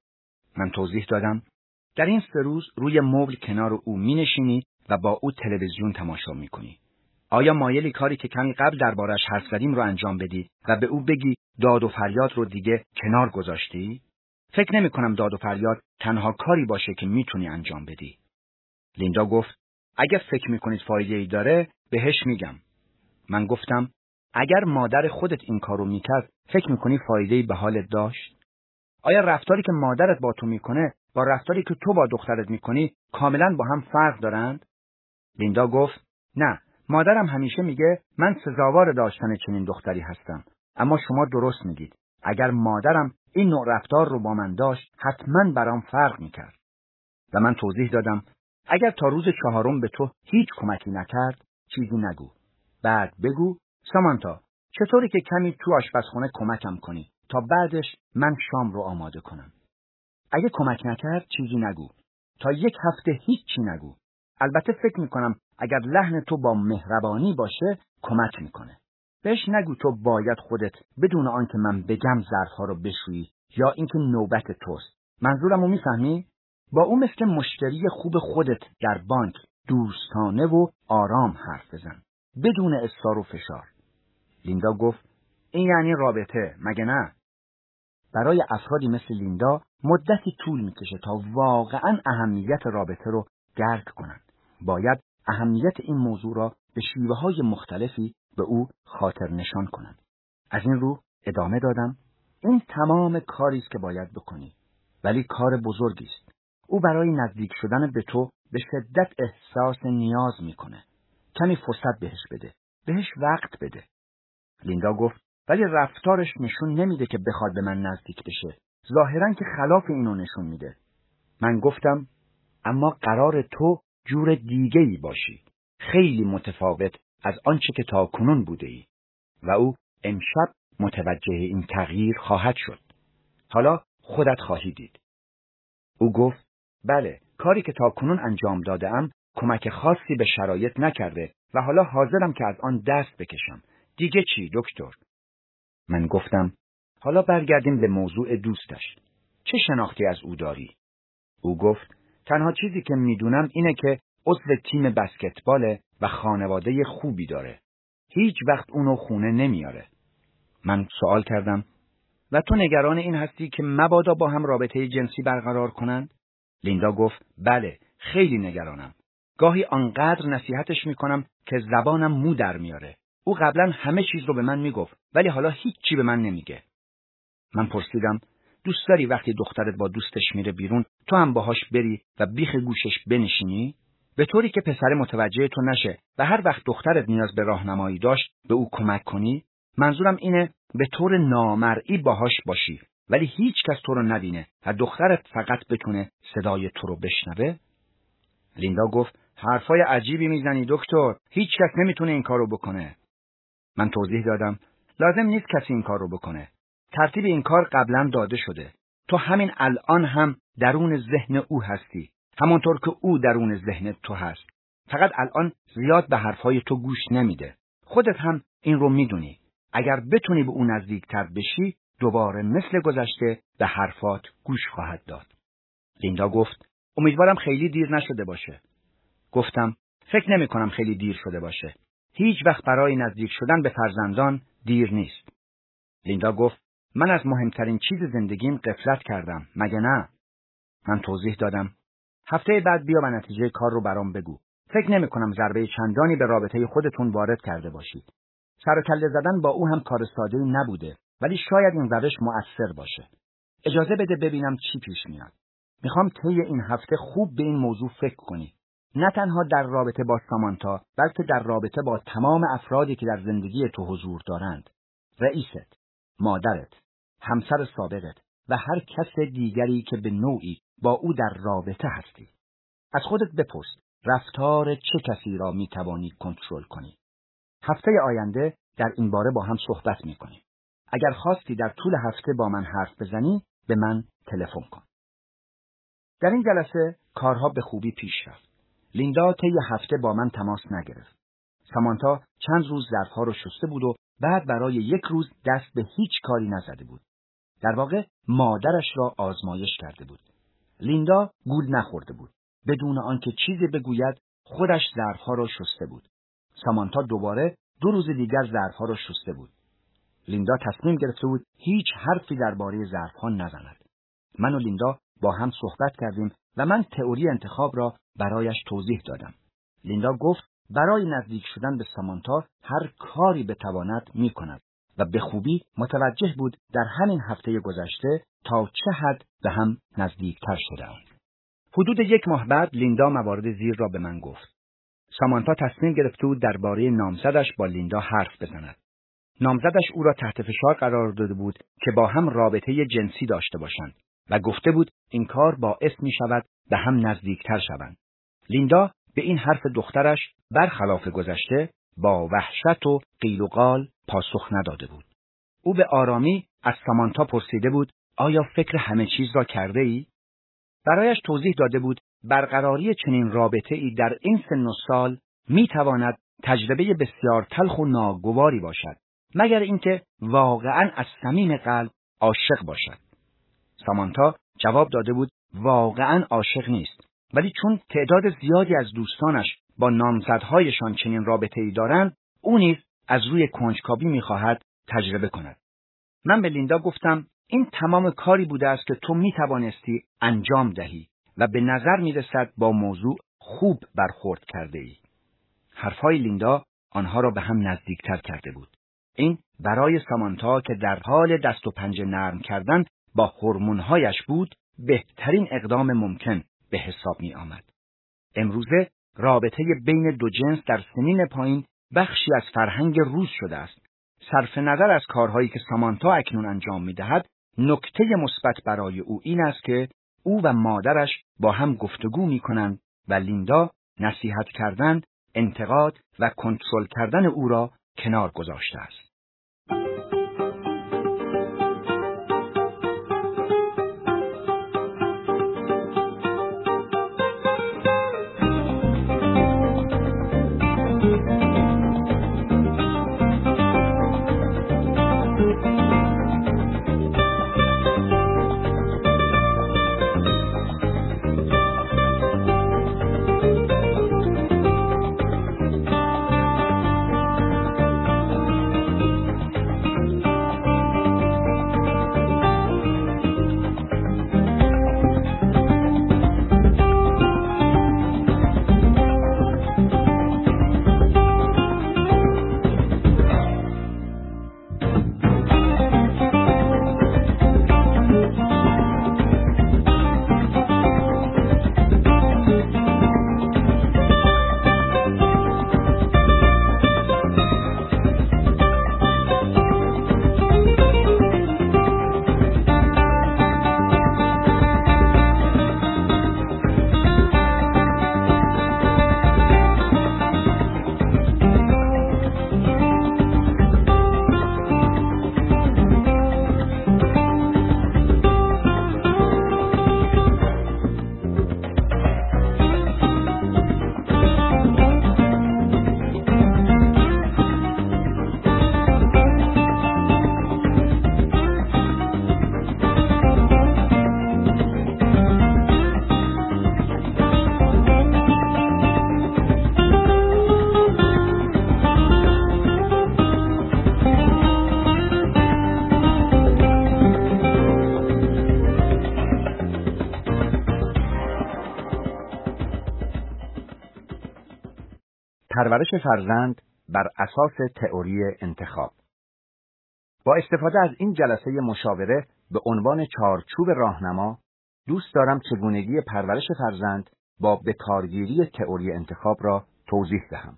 من توضیح دادم در این سه روز روی مبل کنار او مینشینی و با او تلویزیون تماشا میکنی. آیا مایلی کاری که کمی قبل دربارش حرف زدیم رو انجام بدی و به او بگی داد و فریاد رو دیگه کنار گذاشتی؟ فکر نمی کنم داد و فریاد تنها کاری باشه که میتونی انجام بدی. لیندا گفت اگر فکر میکنید فایده‌ای داره بهش میگم. من گفتم اگر مادر خودت این کارو میکرد فکر میکنی فایده‌ای به حالت داشت؟ آیا رفتاری که مادرت با تو میکنه با رفتاری که تو با دخترت میکنی کاملا با هم فرق دارند؟ لیندا گفت نه، مادرم همیشه میگه من سزاوار داشتن چنین دختری هستم. اما شما درست میگید. اگر مادرم این نوع رفتار رو با من داشت حتما برام فرق میکرد. و من توضیح دادم اگر تا روز چهارم به تو هیچ کمکی نکرد چیزی نگو. بعد بگو سامانتا چطوری که کمی تو آشپزخونه کمکم کنی تا بعدش من شام رو آماده کنم. اگه کمک نکرد چیزی نگو. تا یک هفته هیچی نگو. البته فکر میکنم اگر لحن تو با مهربانی باشه کمک میکنه. بهش نگو تو باید خودت بدون آنکه من بگم ظرفها رو بشویی یا اینکه نوبت توست. منظورمو میفهمی؟ با او مثل مشتری خوب خودت در بانک دوستانه و آرام حرف بزن بدون اصرار و فشار. لیندا گفت این یعنی رابطه مگه نه؟ برای افرادی مثل لیندا مدتی طول میکشه تا واقعاً اهمیت رابطه رو درک کنند. باید اهمیت این موضوع را به شیوه‌های مختلفی به او خاطر نشان کنند. از این رو ادامه دادم این تمام کاری است که باید بکنی، ولی کار بزرگی است. او برای نزدیک شدن به تو به شدت احساس نیاز میکنه. کمی فرصت بهش بده. بهش وقت بده. لیندا گفت ولی رفتارش نشون نمیده که بخواد به من نزدیک بشه. ظاهراً که خلاف اینو نشون میده. من گفتم اما قرار تو جور دیگه‌ای باشی. خیلی متفاوت از آنچه که تا کنون بوده ای. و او امشب متوجه این تغییر خواهد شد. حالا خودت خواهی دید. او گفت بله، کاری که تا کنون انجام دادم کمک خاصی به شرایط نکرده و حالا حاضرم که از آن دست بکشم. دیگه چی دکتر؟ من گفتم حالا برگردیم به موضوع دوستش. چه شناختی از او داری؟ او گفت تنها چیزی که میدونم اینه که عضو تیم بسکتباله و خانواده خوبی داره. هیچ وقت اونو خونه نمیاره. من سوال کردم و تو نگران این هستی که مبادا با هم رابطه جنسی برقرار کنند؟ لیندا گفت بله، خیلی نگرانم. گاهی آنقدر نصیحتش میکنم که زبانم مو در میاره. او قبلا همه چیز رو به من میگفت ولی حالا هیچ چی به من نمیگه. من پرسیدم دوست داری وقتی دخترت با دوستش میره بیرون تو هم باهاش بری و بیخ گوشش بنشینی؟ به طوری که پسر متوجه تو نشه و هر وقت دخترت نیاز به راهنمایی داشت به او کمک کنی؟ منظورم اینه به طور نامرئی باهاش باشی ولی هیچ کس تو رو نبینه و دخترت فقط بتونه صدای تو رو بشنوه؟ لیندا گفت حرفای عجیبی میزنی دکتر. هیچ کس نمیتونه این کارو بکنه. من توضیح دادم لازم نیست کسی این کار رو بکنه. ترتیب این کار قبلا داده شده. تو همین الان هم درون ذهن او هستی. همانطور که او درون ذهن تو هست. فقط الان زیاد به حرفای تو گوش نمیده. خودت هم این رو میدونی. اگر بتونی به او نزدیکتر بشی دوباره مثل گذشته به حرفات گوش خواهد داد. لیندا گفت امیدوارم خیلی دیر نشده باشه. گفتم فکر نمی کنم خیلی دیر شده باشه. هیچ وقت برای نزدیک شدن به فرزندان دیر نیست. لیندا گفت من از مهمترین چیز زندگیم غفلت کردم، مگه نه؟ من توضیح دادم هفته بعد بیا و نتیجه کار رو برام بگو. فکر نمی کنم ضربه چندانی به رابطه خودتون وارد کرده باشید. سر و کله زدن با او هم کار ساده‌ای نبوده، ولی شاید این روش مؤثر باشه. اجازه بده ببینم چی پیش میاد. میخوام طی این هفته خوب به این موضوع فکر کنی. نه تنها در رابطه با سامانتا، بلکه در رابطه با تمام افرادی که در زندگی تو حضور دارند. رئیست، مادرت، همسر سابقت و هر کس دیگری که به نوعی با او در رابطه هستی. از خودت بپرس رفتار چه کسی را میتوانی کنترل کنی. هفته آینده در این باره با هم صحبت میکنیم. اگر خواستی در طول هفته با من حرف بزنی، به من تلفن کن. در این جلسه کارها به خوبی پیش رفت. لیندا طی هفته با من تماس نگرفت. سامانتا چند روز ظرفها رو شسته بود و بعد برای یک روز دست به هیچ کاری نزده بود. در واقع مادرش را آزمایش کرده بود. لیندا گول نخورده بود. بدون آنکه چیزی بگوید خودش ظرفها را شسته بود. سامانتا دوباره دو روز دیگر ظرفها را شسته بود. لیندا تصمیم گرفته بود هیچ حرفی درباره ظرفها نزند. من و لیندا با هم صحبت کردیم و من تئوری انتخاب را برایش توضیح دادم. لیندا گفت برای نزدیک شدن به سامانتا هر کاری بتواند می‌کند و به خوبی متوجه بود در همین هفته گذشته تا چه حد به هم نزدیکتر شدند. حدود یک ماه بعد لیندا موارد زیر را به من گفت. سامانتا تصمیم گرفته بود درباره نامزدش با لیندا حرف بزند. نامزدش او را تحت فشار قرار داده بود که با هم رابطه جنسی داشته باشند و گفته بود این کار باعث می شود به هم نزدیکتر شوند. لیندا به این حرف دخترش برخلاف گذشته با وحشت و قیل و قال پاسخ نداده بود. او به آرامی از سامانتا پرسیده بود آیا فکر همه چیز را کرده ای؟ برایش توضیح داده بود برقراری چنین رابطه ای در این سن و سال می تواند تجربه بسیار تلخ و ناگواری باشد، مگر اینکه واقعاً از صمیم قلب عاشق باشد. سامانتا جواب داده بود واقعاً عاشق نیست، ولی چون تعداد زیادی از دوستانش با نامزدهایشان چنین رابطه‌ای دارند، او نیز از روی کنجکاوی می‌خواهد تجربه کند. من به لیندا گفتم این تمام کاری بوده است که تو می‌توانستی انجام دهی و به نظر می‌رسد با موضوع خوب برخورد کرده ای. حرفهای لیندا آنها را به هم نزدیکتر کرده بود. این برای سامانتا که در حال دست و پنجه نرم کردن با هورمون‌هایش بود بهترین اقدام ممکن به حساب می آمد. امروزه رابطه بین دو جنس در سنین پایین بخشی از فرهنگ روز شده است. صرف نظر از کارهایی که سامانتا اکنون انجام می دهد، نکته مثبت برای او این است که او و مادرش با هم گفتگو می کنند و لیندا نصیحت کردن، انتقاد و کنترل کردن او را کنار گذاشته است. پرورش فرزند بر اساس تئوری انتخاب. با استفاده از این جلسه مشاوره به عنوان چارچوب راهنما، دوست دارم چگونگی پرورش فرزند با به کارگیری تئوری انتخاب را توضیح دهم.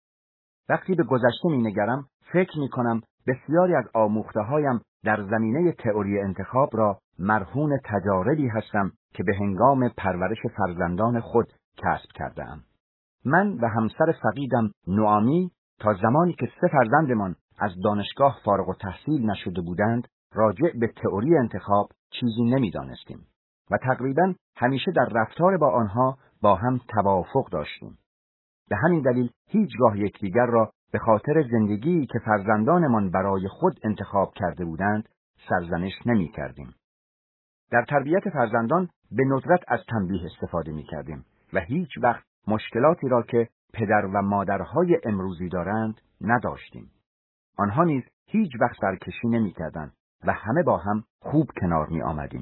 وقتی به گذشته می‌نگرم، فکر می‌کنم بسیاری از آموخته‌هایم در زمینه تئوری انتخاب را مرهون تجاربی هستم که به هنگام پرورش فرزندان خود کسب کرده‌ام. من و همسر فقیدم نوامی تا زمانی که سه فرزندمان از دانشگاه فارغ التحصیل نشده بودند، راجع به تئوری انتخاب چیزی نمی‌دانستیم و تقریباً همیشه در رفتار با آنها با هم توافق داشتیم. به همین دلیل هیچگاه یکدیگر را به خاطر زندگی که فرزندانمان برای خود انتخاب کرده بودند سرزنش نمی‌کردیم. در تربیت فرزندان به ندرت از تنبیه استفاده می‌کردیم و هیچ وقت مشکلاتی را که پدر و مادرهای امروزی دارند نداشتیم. آنها نیز هیچ وقت سرکشی نمی‌کردند و همه با هم خوب کنار می‌آمدیم.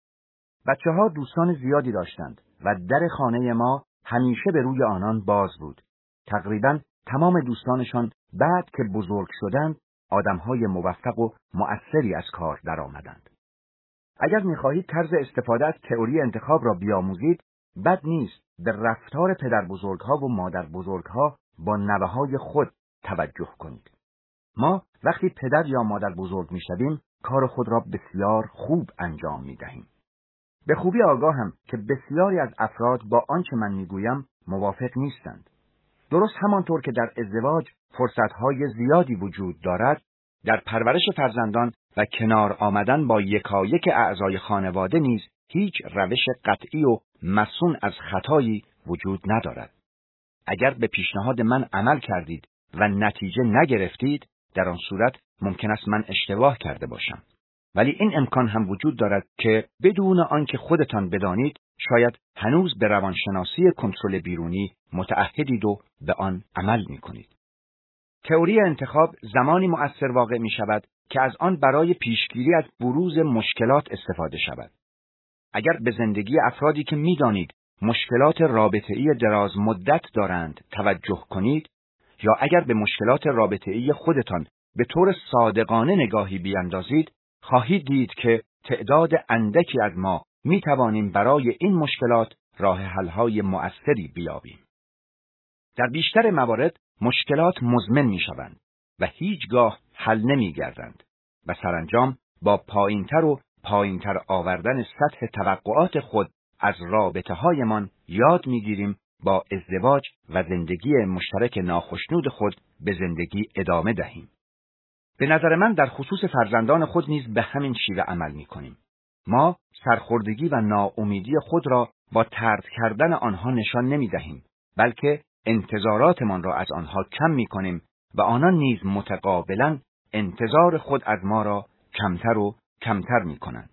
بچه‌ها دوستان زیادی داشتند و در خانه ما همیشه به روی آنان باز بود. تقریباً تمام دوستانشان بعد که بزرگ شدند آدم‌های موفق و مؤثری از کار درآمدند. اگر می‌خواهید طرز استفاده از تئوری انتخاب را بیاموزید، بد نیست به رفتار پدر بزرگ‌ها و مادر بزرگ‌ها با نوه‌های خود توجه کنید. ما وقتی پدر یا مادر بزرگ می‌شویم، کار خود را بسیار خوب انجام می‌دهیم. به خوبی آگاهم که بسیاری از افراد با آنچه من میگویم موافق نیستند. درست همانطور که در ازدواج فرصتهای زیادی وجود دارد، در پرورش فرزندان و کنار آمدن با یکایک اعضای خانواده نیز هیچ روش قطعی و مصون از خطایی وجود ندارد. اگر به پیشنهاد من عمل کردید و نتیجه نگرفتید، در آن صورت ممکن است من اشتباه کرده باشم. ولی این امکان هم وجود دارد که بدون آنکه خودتان بدانید، شاید هنوز به روانشناسی کنترل بیرونی متعهدید و به آن عمل می‌کنید. تئوری انتخاب زمانی مؤثر واقع می‌شود که از آن برای پیشگیری از بروز مشکلات استفاده شود. اگر به زندگی افرادی که می‌دانید مشکلات رابطه‌ای دراز مدت دارند توجه کنید، یا اگر به مشکلات رابطه‌ای خودتان به طور صادقانه نگاهی بیاندازید، خواهید دید که تعداد اندکی از ما می توانیم برای این مشکلات راه حل‌های مؤثری بیابیم. در بیشتر موارد مشکلات مزمن می شوند و هیچگاه حل نمی گردند و سرانجام با پایینتر و پایینتر آوردن سطح توقعات خود از رابطه هایمان یاد می گیریم با ازدواج و زندگی مشترک ناخشنود خود به زندگی ادامه دهیم. به نظر من در خصوص فرزندان خود نیز به همین شیوه عمل می کنیم. ما سرخوردگی و ناامیدی خود را با طرد کردن آنها نشان نمی دهیم، بلکه انتظاراتمان را از آنها کم می کنیم و آنان نیز متقابلاً انتظار خود از ما را کمتر و کمتر می کنند.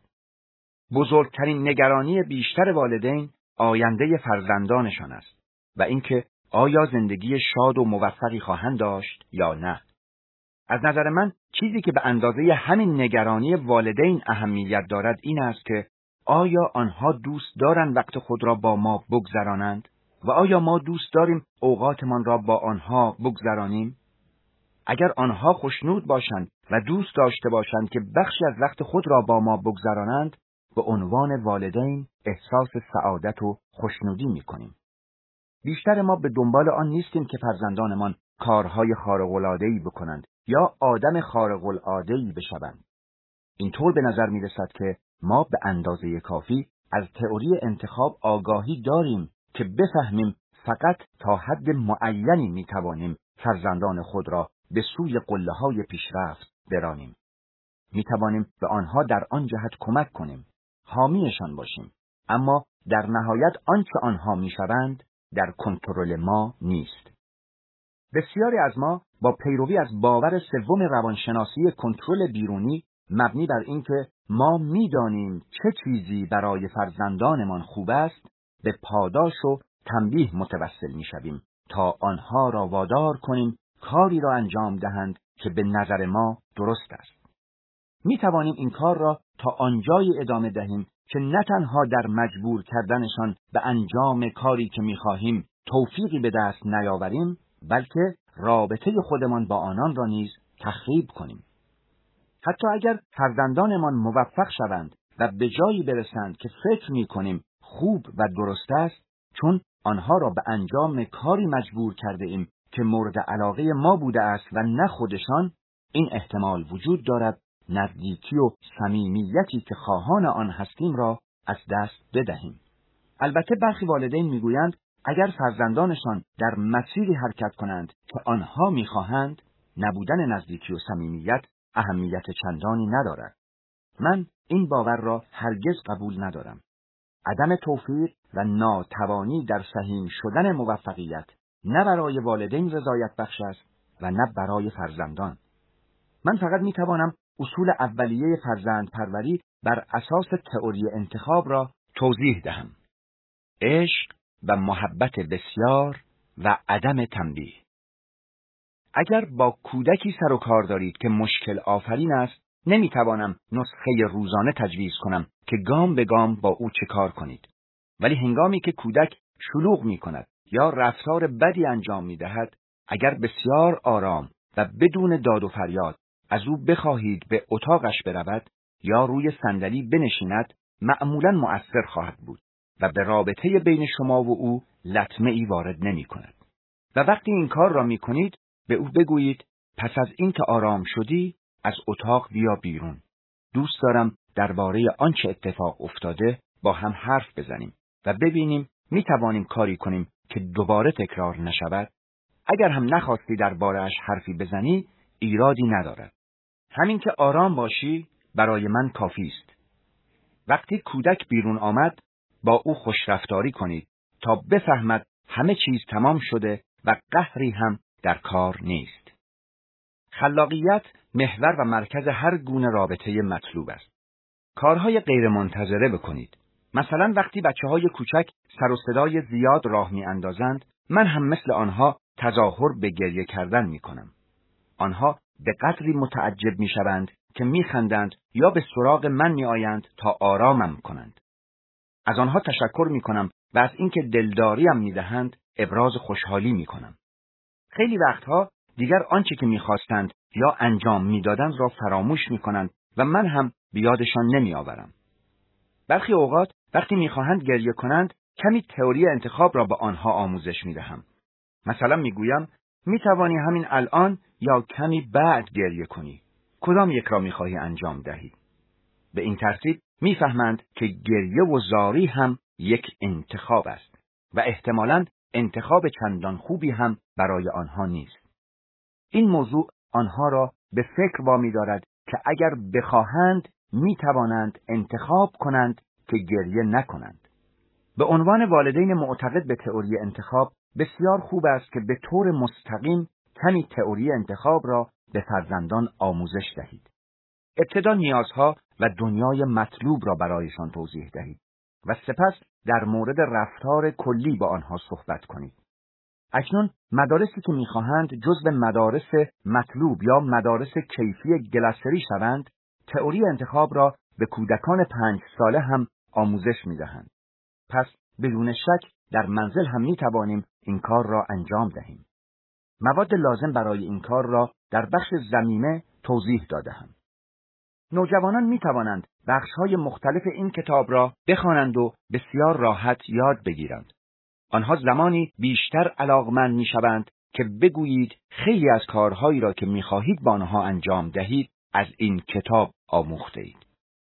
بزرگترین نگرانی بیشتر والدین آینده فرزندانشان است و اینکه آیا زندگی شاد و موفقی خواهند داشت یا نه. از نظر من چیزی که به اندازه همین نگرانی والدین اهمیت دارد این است که آیا آنها دوست دارند وقت خود را با ما بگذرانند و آیا ما دوست داریم اوقاتمان را با آنها بگذرانیم؟ اگر آنها خوشنود باشند و دوست داشته باشند که بخشی از وقت خود را با ما بگذرانند، به عنوان والدین احساس سعادت و خوشنودی می‌کنیم. بیشتر ما به دنبال آن نیستیم که فرزندانمان کارهای خارق‌العاده‌ای بکنند یا آدم خارق‌العاده‌ای بشوند. اینطور به نظر می‌رسد که ما به اندازه کافی از تئوری انتخاب آگاهی داریم که بفهمیم فقط تا حد معینی می‌توانیم فرزندان خود را به سوی قله‌های پیشرفت برانیم. می‌توانیم به آنها در آن جهت کمک کنیم، حامیشان باشیم، اما در نهایت آنچه آنها می‌شوند در کنترل ما نیست. بسیاری از ما با پیروی از باور سوم روانشناسی کنترل بیرونی مبنی بر اینکه ما می‌دانیم چه چیزی برای فرزندانمان خوب است، به پاداش و تنبیه متوسل می‌شویم تا آنها را وادار کنیم کاری را انجام دهند که به نظر ما درست است. می‌توانیم این کار را تا آنجایی ادامه دهیم که نه تنها در مجبور کردنشان به انجام کاری که می‌خواهیم توفیقی به دست نیاوریم، بلکه رابطه خودمان با آنان را نیز تخریب کنیم. حتی اگر فرزندانمان موفق شوند و به جایی برسند که فکر می‌کنیم خوب و درست است، چون آنها را به انجام کاری مجبور کرده ایم که مورد علاقه ما بوده است و نه خودشان، این احتمال وجود دارد نزدیکی و صمیمیتی که خواهان آن هستیم را از دست بدهیم. البته برخی والدین میگویند اگر فرزندانشان در مسیری حرکت کنند که آنها میخواهند، نبودن نزدیکی و صمیمیت اهمیت چندانی ندارد. من این باور را هرگز قبول ندارم. عدم توفیق و ناتوانی در سهیم شدن موفقیت نه برای والدین رضایت بخش است و نه برای فرزندان. من فقط میتوانم اصول اولیه فرزند پروری بر اساس تئوری انتخاب را توضیح دهم. عشق و محبت بسیار و عدم تنبیه. اگر با کودکی سر و کار دارید که مشکل آفرین است، نمیتوانم نسخه روزانه تجویز کنم که گام به گام با او چه کار کنید. ولی هنگامی که کودک شلوغ می کند یا رفتار بدی انجام می دهد، اگر بسیار آرام و بدون داد و فریاد از او بخواهید به اتاقش برود یا روی صندلی بنشیند، معمولاً مؤثر خواهد بود و به رابطه بین شما و او لطمه ای وارد نمی کند. و وقتی این کار را می کنید، به او بگویید پس از این که آرام شدی از اتاق بیا بیرون. دوست دارم درباره آنچه اتفاق افتاده با هم حرف بزنیم و ببینیم می توانیم کاری کنیم که دوباره تکرار نشود. اگر هم نخواستی درباره‌اش حرفی بزنی، ایرادی ندارد. همین که آرام باشی برای من کافی است. وقتی کودک بیرون آمد، با او خوشرفتاری کنید تا بفهمد همه چیز تمام شده و قهری هم در کار نیست. خلاقیت محور و مرکز هر گونه رابطه مطلوب است. کارهای غیر منتظره بکنید. مثلا وقتی بچه‌های کوچک سر و صدای زیاد راه می‌اندازند، من هم مثل آنها تظاهر به گریه کردن می‌کنم. آنها به قدری متعجب می‌شوند که می‌خندند یا به سراغ من می‌آیند تا آرامم کنند. از آنها تشکر می‌کنم و از اینکه دلداریم می‌دهند ابراز خوشحالی می‌کنم. خیلی وقتها دیگر آنچه که می‌خواستند یا انجام می‌دادند را فراموش می‌کنند و من هم به یادشان نمی‌آورم. برخی اوقات وقتی می‌خواهند گریه کنند، کمی تئوری انتخاب را به آنها آموزش می‌دهم. مثلا می‌گویم می‌توانی همین الان یا کمی بعد گریه کنی. کدام یک را می‌خواهی انجام دهی؟ به این ترتیب می‌فهمند که گریه و زاری هم یک انتخاب است و احتمالاً انتخاب چندان خوبی هم برای آنها نیست. این موضوع آنها را به فکر وامی دارد که اگر بخواهند می‌توانند انتخاب کنند که گریه نکنند. به عنوان والدین معتقد به تئوری انتخاب، بسیار خوب است که به طور مستقیم کمی تئوری انتخاب را به فرزندان آموزش دهید. ابتدا نیازها و دنیای مطلوب را برایشان توضیح دهید و سپس در مورد رفتار کلی با آنها صحبت کنید. اکنون مدارسی که می‌خواهند جزو مدارس مطلوب یا مدارس کیفی گلاسری شوند، تئوری انتخاب را به کودکان پنج ساله هم آموزش می‌دهند. پس بدون شک در منزل هم می‌توانیم این کار را انجام دهیم. مواد لازم برای این کار را در بخش ضمیمه توضیح داده‌ام. نوجوانان می‌توانند بخش‌های مختلف این کتاب را بخوانند و بسیار راحت یاد بگیرند. آنها زمانی بیشتر علاقمند می‌شوند که بگویید خیلی از کارهایی را که می‌خواهید با آنها انجام دهید از این کتاب آموخته‌اید.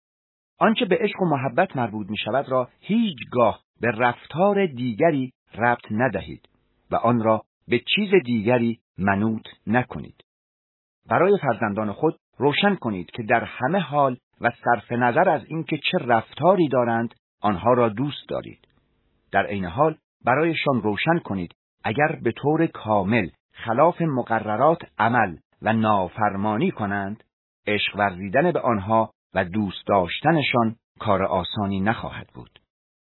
آنچه به عشق و محبت مربوط می‌شود را هیچگاه به رفتار دیگری ربط ندهید و آن را به چیز دیگری منوط نکنید. برای فرزندان خود روشن کنید که در همه حال و صرف نظر از اینکه چه رفتاری دارند آنها را دوست دارید. در عین حال برایشان روشن کنید اگر به طور کامل خلاف مقررات عمل و نافرمانی کنند، عشق ورزیدن به آنها و دوست داشتنشان کار آسانی نخواهد بود.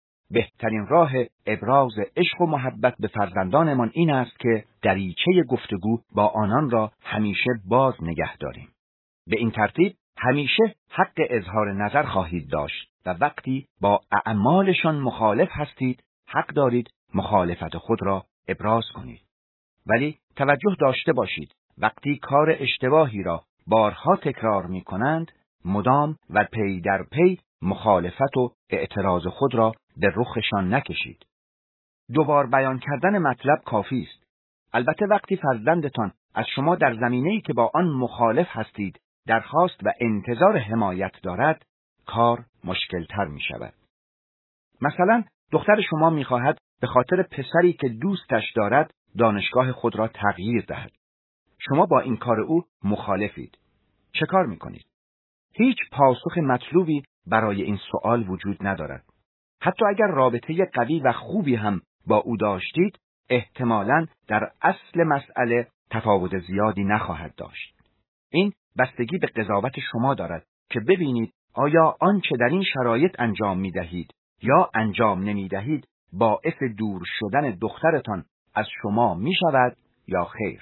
بهترین راه ابراز عشق و محبت به فرزندانمان این است که دریچه گفتگو با آنان را همیشه باز نگه داریم. به این ترتیب همیشه حق اظهار نظر خواهید داشت و وقتی با اعمالشان مخالف هستید، حق دارید مخالفت خود را ابراز کنید. ولی توجه داشته باشید وقتی کار اشتباهی را بارها تکرار می کنند، مدام و پی در پی مخالفت و اعتراض خود را به رخشان نکشید. دوبار بیان کردن مطلب کافی است. البته وقتی فرزندتان از شما در زمینه‌ای که با آن مخالف هستید درخواست و انتظار حمایت دارد، کار مشکل‌تر می شود. مثلا دختر شما می خواهد به خاطر پسری که دوستش دارد دانشگاه خود را تغییر دهد. شما با این کار او مخالفید. چه کار می کنید؟ هیچ پاسخ مطلوبی برای این سوال وجود ندارد. حتی اگر رابطه قوی و خوبی هم با او داشتید، احتمالاً در اصل مسئله تفاوت زیادی نخواهد داشت. این بستگی به قضاوت شما دارد که ببینید آیا آنچه در این شرایط انجام می دهید یا انجام نمی دهید باعث دور شدن دخترتان از شما می شود یا خیر.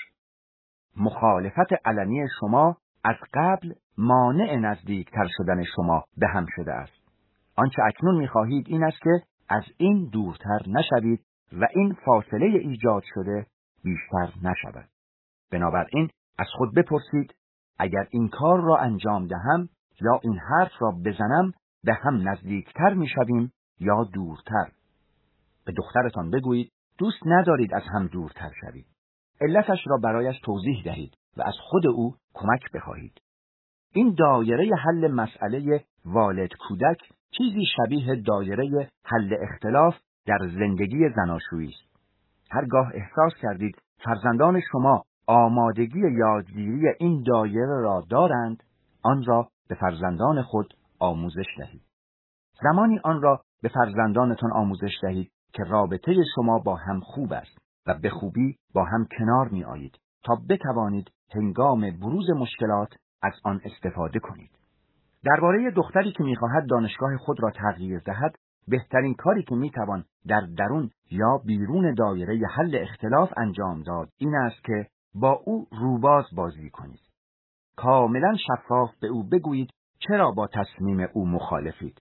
مخالفت علنی شما از قبل مانع نزدیکتر شدن شما به هم شده است. آنچه اکنون می خواهید این است که از این دورتر نشوید و این فاصله ایجاد شده بیشتر نشود. بنابراین از خود بپرسید اگر این کار را انجام دهم یا این حرف را بزنم به هم نزدیکتر می شویم یا دورتر. به دخترتان بگویید دوست ندارید از هم دورتر شوید. علتش را برایش توضیح دهید و از خود او کمک بخواهید. این دایره حل مسئله والد کودک چیزی شبیه دایره حل اختلاف در زندگی زناشویی است. هرگاه احساس کردید فرزندان شما آمادگی یادگیری این دایره را دارند، آن را به فرزندان خود آموزش دهید. زمانی آن را به فرزندانتان آموزش دهید که رابطه شما با هم خوب است و به خوبی با هم کنار می آیید تا بتوانید هنگام بروز مشکلات از آن استفاده کنید. درباره دختری که می‌خواهد دانشگاه خود را تغییر دهد، بهترین کاری که می‌توان در درون یا بیرون دایره حل اختلاف انجام داد این است که با او روباز بازی کنید. کاملا شفاف به او بگویید چرا با تصمیم او مخالفید.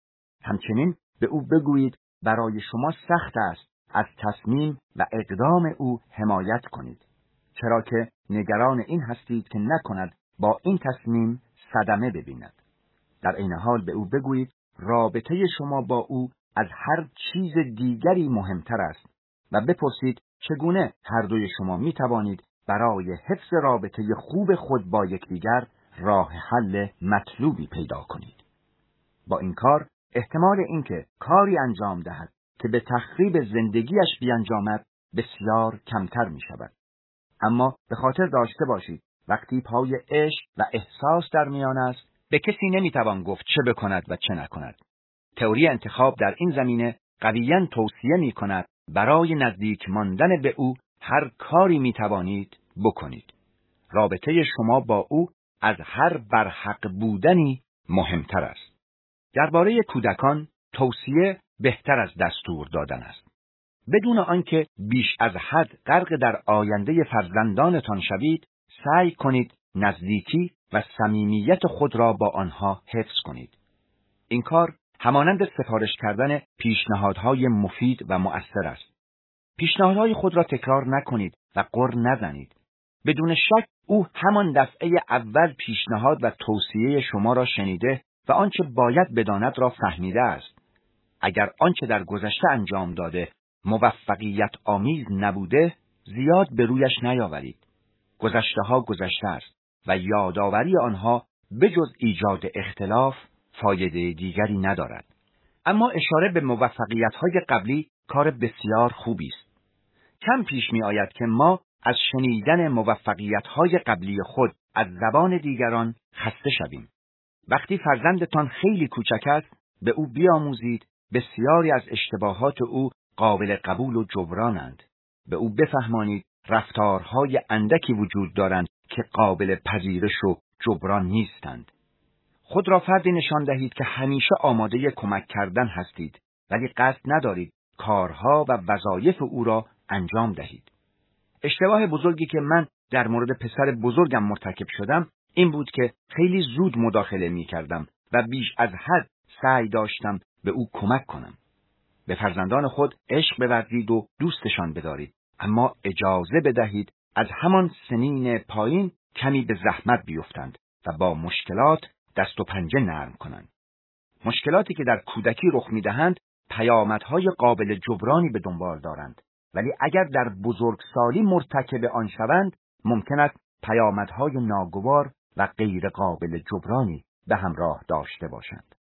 همچنین به او بگویید برای شما سخت است از تصمیم و اقدام او حمایت کنید، چرا که نگران این هستید که نکند با این تصمیم صدمه ببیند. در این حال به او بگویید رابطه شما با او از هر چیز دیگری مهمتر است و بپرسید چگونه هر دوی شما می توانید برای حفظ رابطه خوب خود با یکدیگر راه حل مطلوبی پیدا کنید. با این کار احتمال اینکه کاری انجام دهد که به تخریب زندگیش بیانجامد بسیار کمتر می شود. اما به خاطر داشته باشید وقتی پای عشق و احساس در میان است به کسی نمیتوان گفت چه بکند و چه نکند. تئوری انتخاب در این زمینه قویاً توصیه می کند برای نزدیک ماندن به او هر کاری می توانید بکنید. رابطه شما با او از هر برحق بودنی مهمتر است. درباره کودکان توصیه بهتر از دستور دادن است. بدون آنکه بیش از حد غرق در آینده فرزندانتان شوید، سعی کنید نزدیکی و صمیمیت خود را با آنها حفظ کنید. این کار همانند سفارش کردن پیشنهادهای مفید و مؤثر است. پیشنهادهای خود را تکرار نکنید و غر نزنید. بدون شک او همان دفعه اول پیشنهاد و توصیه شما را شنیده و آنچه باید بداند را فهمیده است. اگر آنچه در گذشته انجام داده موفقیت آمیز نبوده، زیاد به رویش نیاورید. گذشته ها گذشته است و یادآوری آنها بجز ایجاد اختلاف فایده دیگری ندارد. اما اشاره به موفقیت‌های قبلی کار بسیار خوبی است. کم پیش می آید که ما از شنیدن موفقیت‌های قبلی خود از زبان دیگران خسته شویم. وقتی فرزندتان خیلی کوچک است، به او بیاموزید بسیاری از اشتباهات او قابل قبول و جبرانند. به او بفهمانید رفتارهای اندکی وجود دارند که قابل پذیرش و جبران نیستند. خود را فردی نشان دهید که همیشه آماده کمک کردن هستید، ولی قصد ندارید کارها و وظایف او را انجام دهید. اشتباه بزرگی که من در مورد پسر بزرگم مرتکب شدم این بود که خیلی زود مداخله می کردم و بیش از حد سعی داشتم به او کمک کنم. به فرزندان خود عشق بورزید و دوستشان بدارید، اما اجازه بدهید از همان سنین پایین کمی به زحمت بیفتند و با مشکلات دست و پنجه نرم کنند. مشکلاتی که در کودکی رخ می‌دهند پیامدهای قابل جبرانی به دنبال دارند، ولی اگر در بزرگسالی مرتکب آن شوند ممکن است پیامدهای ناگوار و غیر قابل جبرانی به همراه داشته باشند.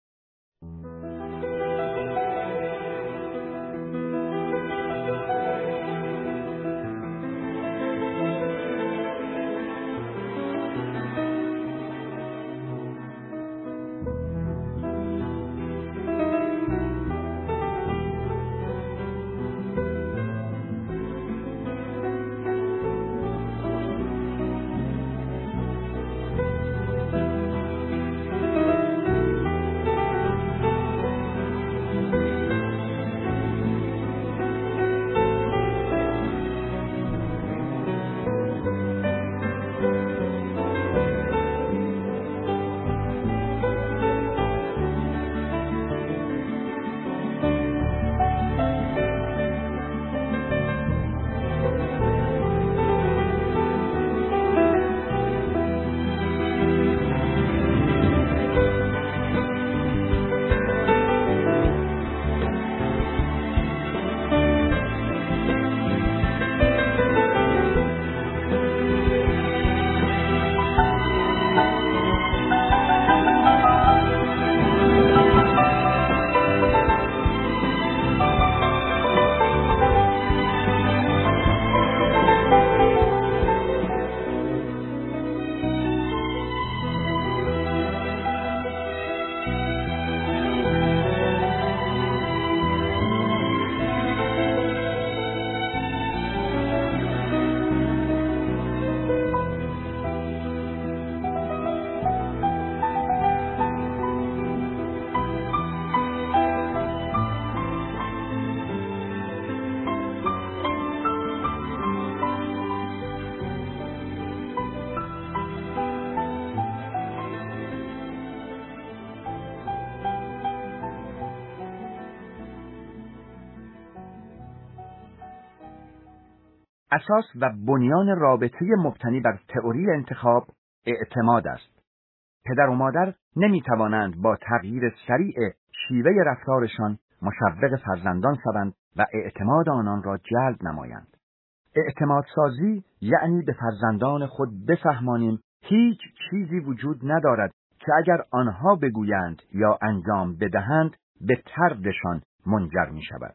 اساس و بنیان رابطه مبتنی بر تئوری انتخاب اعتماد است. پدر و مادر نمی توانند با تغییر سریع شیوه رفتارشان مشوق فرزندان شوند و اعتماد آنان را جلب نمایند. اعتماد سازی یعنی به فرزندان خود بفهمانیم هیچ چیزی وجود ندارد که اگر آنها بگویند یا انجام بدهند به طردشان منجر می شود.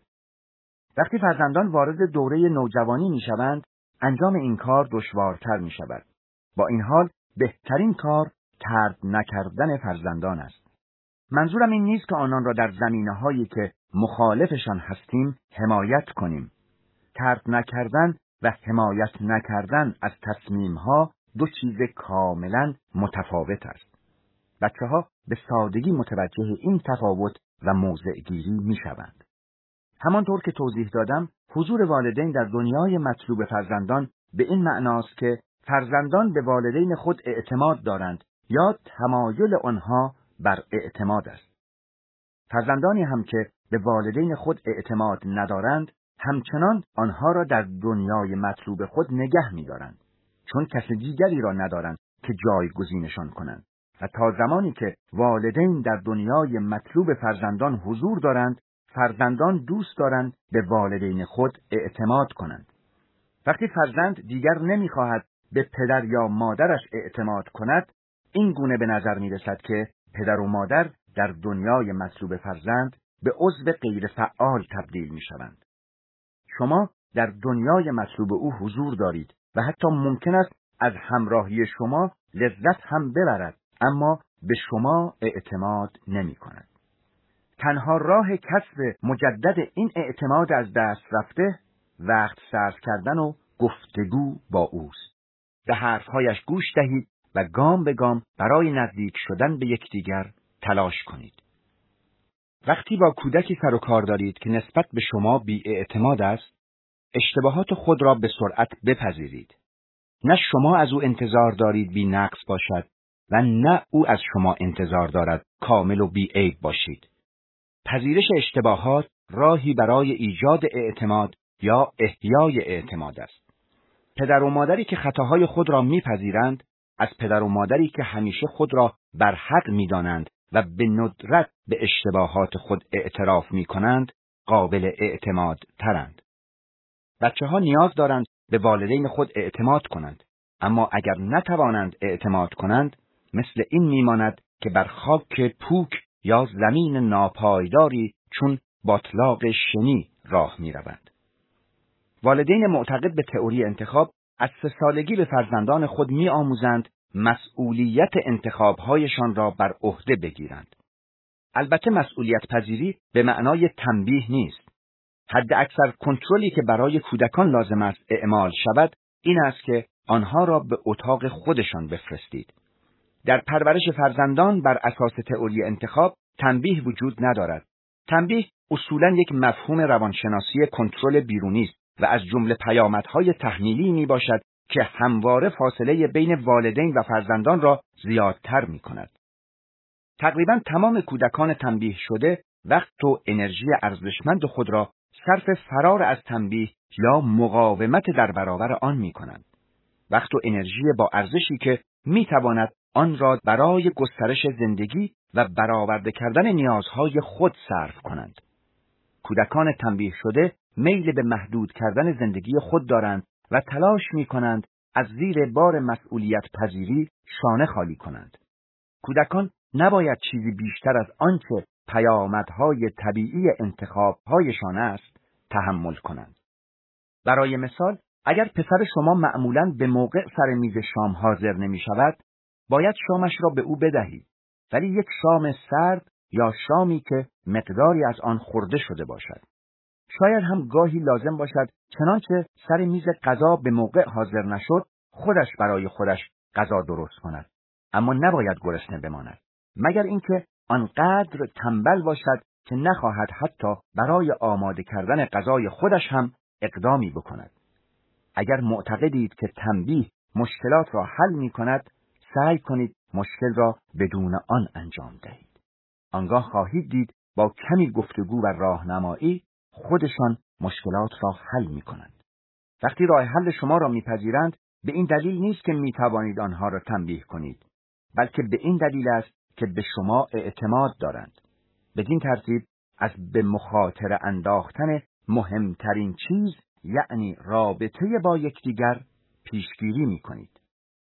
وقتی فرزندان وارد دوره نوجوانی می شوند، انجام این کار دشوارتر می شود. با این حال بهترین کار طرد نکردن فرزندان است. منظورم این نیست که آنان را در زمینه‌هایی که مخالفشان هستیم حمایت کنیم. طرد نکردن و حمایت نکردن از تصمیم‌ها دو چیز کاملاً متفاوت است. بچه‌ها به سادگی متوجه این تفاوت و موضع‌گیری می‌شوند. همانطور که توضیح دادم، حضور والدین در دنیای مطلوب فرزندان به این معناست که فرزندان به والدین خود اعتماد دارند یا تمایل آنها بر اعتماد است. فرزندانی هم که به والدین خود اعتماد ندارند، همچنان آنها را در دنیای مطلوب خود نگه می‌دارند، چون کسی دیگری را ندارند که جایگزینشان کنند. و تا زمانی که والدین در دنیای مطلوب فرزندان حضور دارند، فرزندان دوست دارند به والدین خود اعتماد کنند. وقتی فرزند دیگر نمی‌خواهد به پدر یا مادرش اعتماد کند، این گونه به نظر می‌رسد که پدر و مادر در دنیای مطلوب فرزند به عضو غیر فعال تبدیل می‌شوند. شما در دنیای مطلوب او حضور دارید و حتی ممکن است از همراهی شما لذت هم ببرد، اما به شما اعتماد نمی‌کند. تنها راه کسب مجدد این اعتماد از دست رفته وقت صرف کردن و گفتگو با اوست. به حرفهایش گوش دهید و گام به گام برای نزدیک شدن به یکدیگر تلاش کنید. وقتی با کودکی سر و کار دارید که نسبت به شما بی‌اعتماد است، اشتباهات خود را به سرعت بپذیرید. نه شما از او انتظار دارید بی نقص باشد و نه او از شما انتظار دارد کامل و بی عیب باشید. پذیرش اشتباهات راهی برای ایجاد اعتماد یا احیای اعتماد است. پدر و مادری که خطاهای خود را میپذیرند، از پدر و مادری که همیشه خود را بر حق میدانند و به ندرت به اشتباهات خود اعتراف میکنند، قابل اعتماد ترند. بچه ها نیاز دارند به والدین خود اعتماد کنند، اما اگر نتوانند اعتماد کنند، مثل این میماند که بر خاک پوک یا زمین ناپایداری چون باطلاق شنی راه میروند. والدین معتقد به تئوری انتخاب از سه سالگی به فرزندان خود می‌آموزند مسئولیت انتخاب‌هایشان را بر عهده بگیرند. البته مسئولیت پذیری به معنای تنبیه نیست. حد اکثر کنترلی که برای کودکان لازم است اعمال شود این است که آنها را به اتاق خودشان بفرستید. در پرورش فرزندان بر اساس تئوری انتخاب تنبیه وجود ندارد. تنبیه اصولاً یک مفهوم روانشناسی کنترل بیرونی است و از جمله پیامدهای تحمیلی می باشد که همواره فاصله بین والدین و فرزندان را زیادتر می کند. تقریباً تمام کودکان تنبیه شده وقت و انرژی ارزشمند خود را صرف فرار از تنبیه یا مقاومت در برابر آن می کنند. وقت و انرژی با ارزشی که می تواند آن را برای گسترش زندگی و برآورده کردن نیازهای خود صرف کنند. کودکان تنبیه شده میل به محدود کردن زندگی خود دارند و تلاش می کنند از زیر بار مسئولیت پذیری شانه خالی کنند. کودکان نباید چیزی بیشتر از آنچه پیامدهای طبیعی انتخاب‌هایشان است تحمل کنند. برای مثال، اگر پسر شما معمولاً به موقع سر میز شام حاضر نمی شود، باید شامش را به او بدهید، ولی یک شام سرد یا شامی که مقداری از آن خورده شده باشد. شاید هم گاهی لازم باشد چنانچه سر میز غذا به موقع حاضر نشد، خودش برای خودش غذا درست کند، اما نباید گرسنه بماند، مگر اینکه آنقدر تنبل باشد که نخواهد حتی برای آماده کردن غذای خودش هم اقدامی بکند. اگر معتقدید که تنبیه مشکلات را حل می کند، سعی کنید مشکل را بدون آن انجام دهید. آنگاه خواهید دید با کمی گفتگو و راهنمایی خودشان مشکلات را حل می کنند. وقتی راه حل شما را میپذیرند، به این دلیل نیست که می توانید آنها را تنبیه کنید، بلکه به این دلیل است که به شما اعتماد دارند. بدین ترتیب از به مخاطره انداختن مهمترین چیز، یعنی رابطه با یکدیگر، پیشگیری می کنید.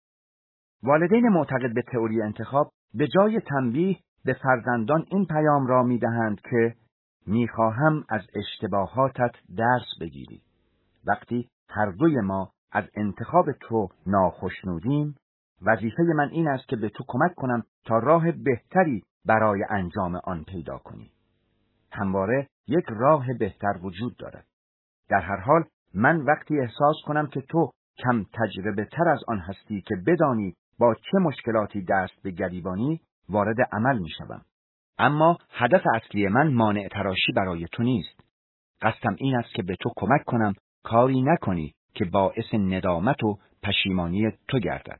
والدین معتقد به تئوری انتخاب به جای تنبیه به فرزندان این پیام را می دهند که می خواهم از اشتباهاتت درس بگیری. وقتی هر دوی ما از انتخاب تو ناخشنودیم، وظیفه من این است که به تو کمک کنم تا راه بهتری برای انجام آن پیدا کنی. همواره یک راه بهتر وجود دارد. در هر حال من وقتی احساس کنم که تو کم تجربه تر از آن هستی که بدانی با چه مشکلاتی دست به گریبانی، وارد عمل می شوم. اما هدف اصلی من مانع تراشی برای تو نیست. قصدم این است که به تو کمک کنم کاری نکنی که باعث ندامت و پشیمانی تو گردد.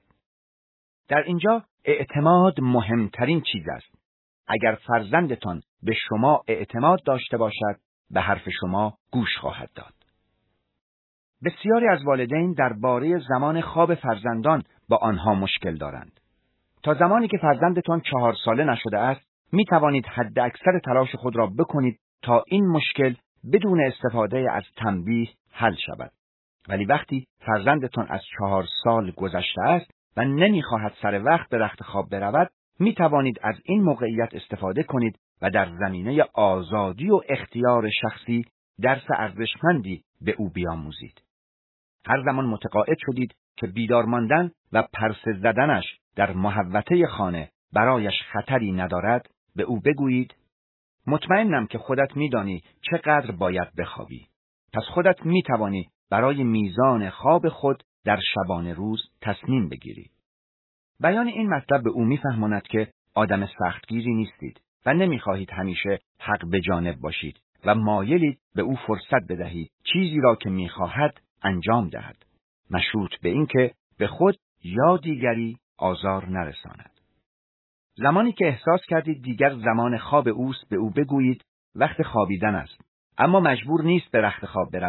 در اینجا اعتماد مهمترین چیز است. اگر فرزندتان به شما اعتماد داشته باشد، به حرف شما گوش خواهد داد. بسیاری از والدین درباره زمان خواب فرزندان با آنها مشکل دارند. تا زمانی که فرزندتان چهار ساله نشده است، می توانید حد اکثر تلاش خود را بکنید تا این مشکل بدون استفاده از تنبیه حل شود. ولی وقتی فرزندتان از چهار سال گذشته است و نمی‌خواهد سر وقت به رخت خواب برود، می توانید از این موقعیت استفاده کنید و در زمینه آزادی و اختیار شخصی درس ارزشمندی به او بیاموزید. هر زمان متقاعد شدید که بیدار ماندن و پرسه زدنش در محوطه خانه برایش خطری ندارد، به او بگویید: مطمئنم که خودت می‌دانی چقدر باید بخوابی. پس خودت می‌توانی برای میزان خواب خود در شبانه روز تصمیم بگیری. بیان این مطلب به او می‌فهماند که آدم سختگیری نیستید و نمی‌خواهید همیشه حق به جانب باشید و مایلید به او فرصت بدهید چیزی را که می‌خواهد انجام دهد، مشروط به این که به خود یا دیگری آزار نرساند. زمانی که احساس کردید دیگر زمان خواب اوست، به او بگویید وقت خوابیدن است، اما مجبور نیست به رخت خواب برود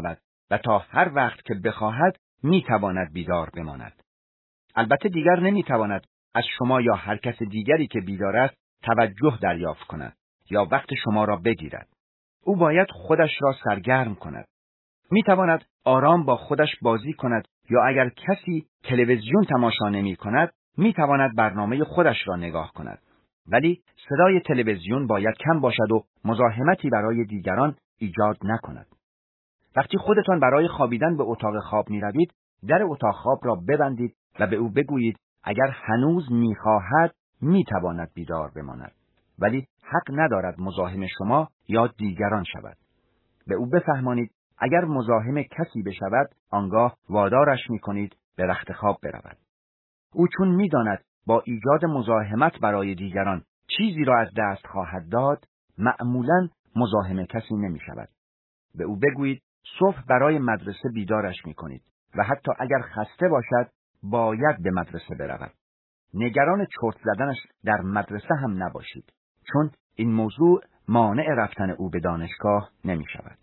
و تا هر وقت که بخواهد میتواند بیدار بماند. البته دیگر نمیتواند از شما یا هر کس دیگری که بیدار است توجه دریافت کند یا وقت شما را بگیرد. او باید خودش را سرگرم کند. میتواند آرام با خودش بازی کند یا اگر کسی تلویزیون تماشا نمی کند میتواند برنامه خودش را نگاه کند. ولی صدای تلویزیون باید کم باشد و مزاحمتی برای دیگران ایجاد نکند. وقتی خودتان برای خوابیدن به اتاق خواب می روید، در اتاق خواب را ببندید و به او بگویید اگر هنوز می خواهد می تواند بیدار بماند. ولی حق ندارد مزاحم شما یا دیگران شود. به او بفهمانید اگر مزاحم کسی بشود، آنگاه وادارش می کنید به رخت خواب برود. او چون می داند با ایجاد مزاحمت برای دیگران چیزی را از دست خواهد داد، معمولاً مزاحم کسی نمی شود. به او بگویید صبح برای مدرسه بیدارش می کنید و حتی اگر خسته باشد باید به مدرسه برود. نگران چرت زدنش در مدرسه هم نباشید، چون این موضوع مانع رفتن او به دانشگاه نمی شود.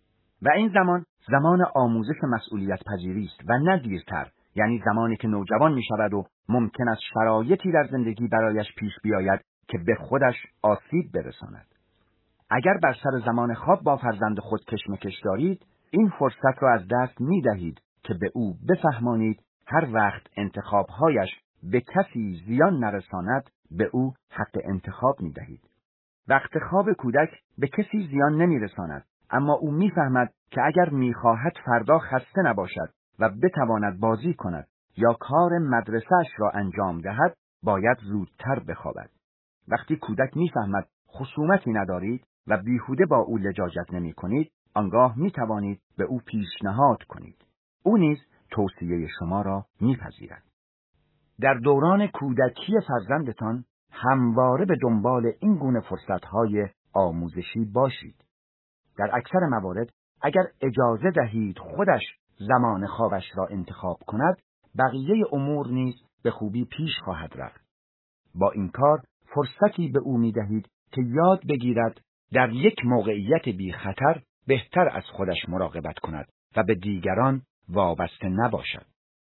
و این زمان زمان آموزش مسئولیت پذیری است و نه دیرتر، یعنی زمانی که نوجوان می شود و ممکن است شرایطی در زندگی برایش پیش بیاید که به خودش آسیب برساند. اگر بر سر زمان خواب با فرزند خود کشمکش دارید، این فرصت را از دست می دهید که به او بفهمانید هر وقت انتخابهایش به کسی زیان نرساند، به او حق انتخاب می دهید. وقت خواب کودک به کسی زیان نمی رساند، اما او می فهمد که اگر می خواهد فردا خسته نباشد و بتواند بازی کند یا کار مدرسه‌اش را انجام دهد، باید زودتر بخوابد. وقتی کودک می فهمد خصومتی ندارید و بیهوده با او لجاجت نمی کنید، آنگاه می توانید به او پیشنهاد کنید. او نیز توصیه شما را می پذیرد. در دوران کودکی فرزندتان همواره به دنبال این گونه فرصتهای آموزشی باشید. در اکثر موارد اگر اجازه دهید خودش زمان خوابش را انتخاب کند، بقیه امور نیز به خوبی پیش خواهد رفت. با این کار فرصتی به او می دهید که یاد بگیرد در یک موقعیت بی خطر بهتر از خودش مراقبت کند و به دیگران وابسته نباشد.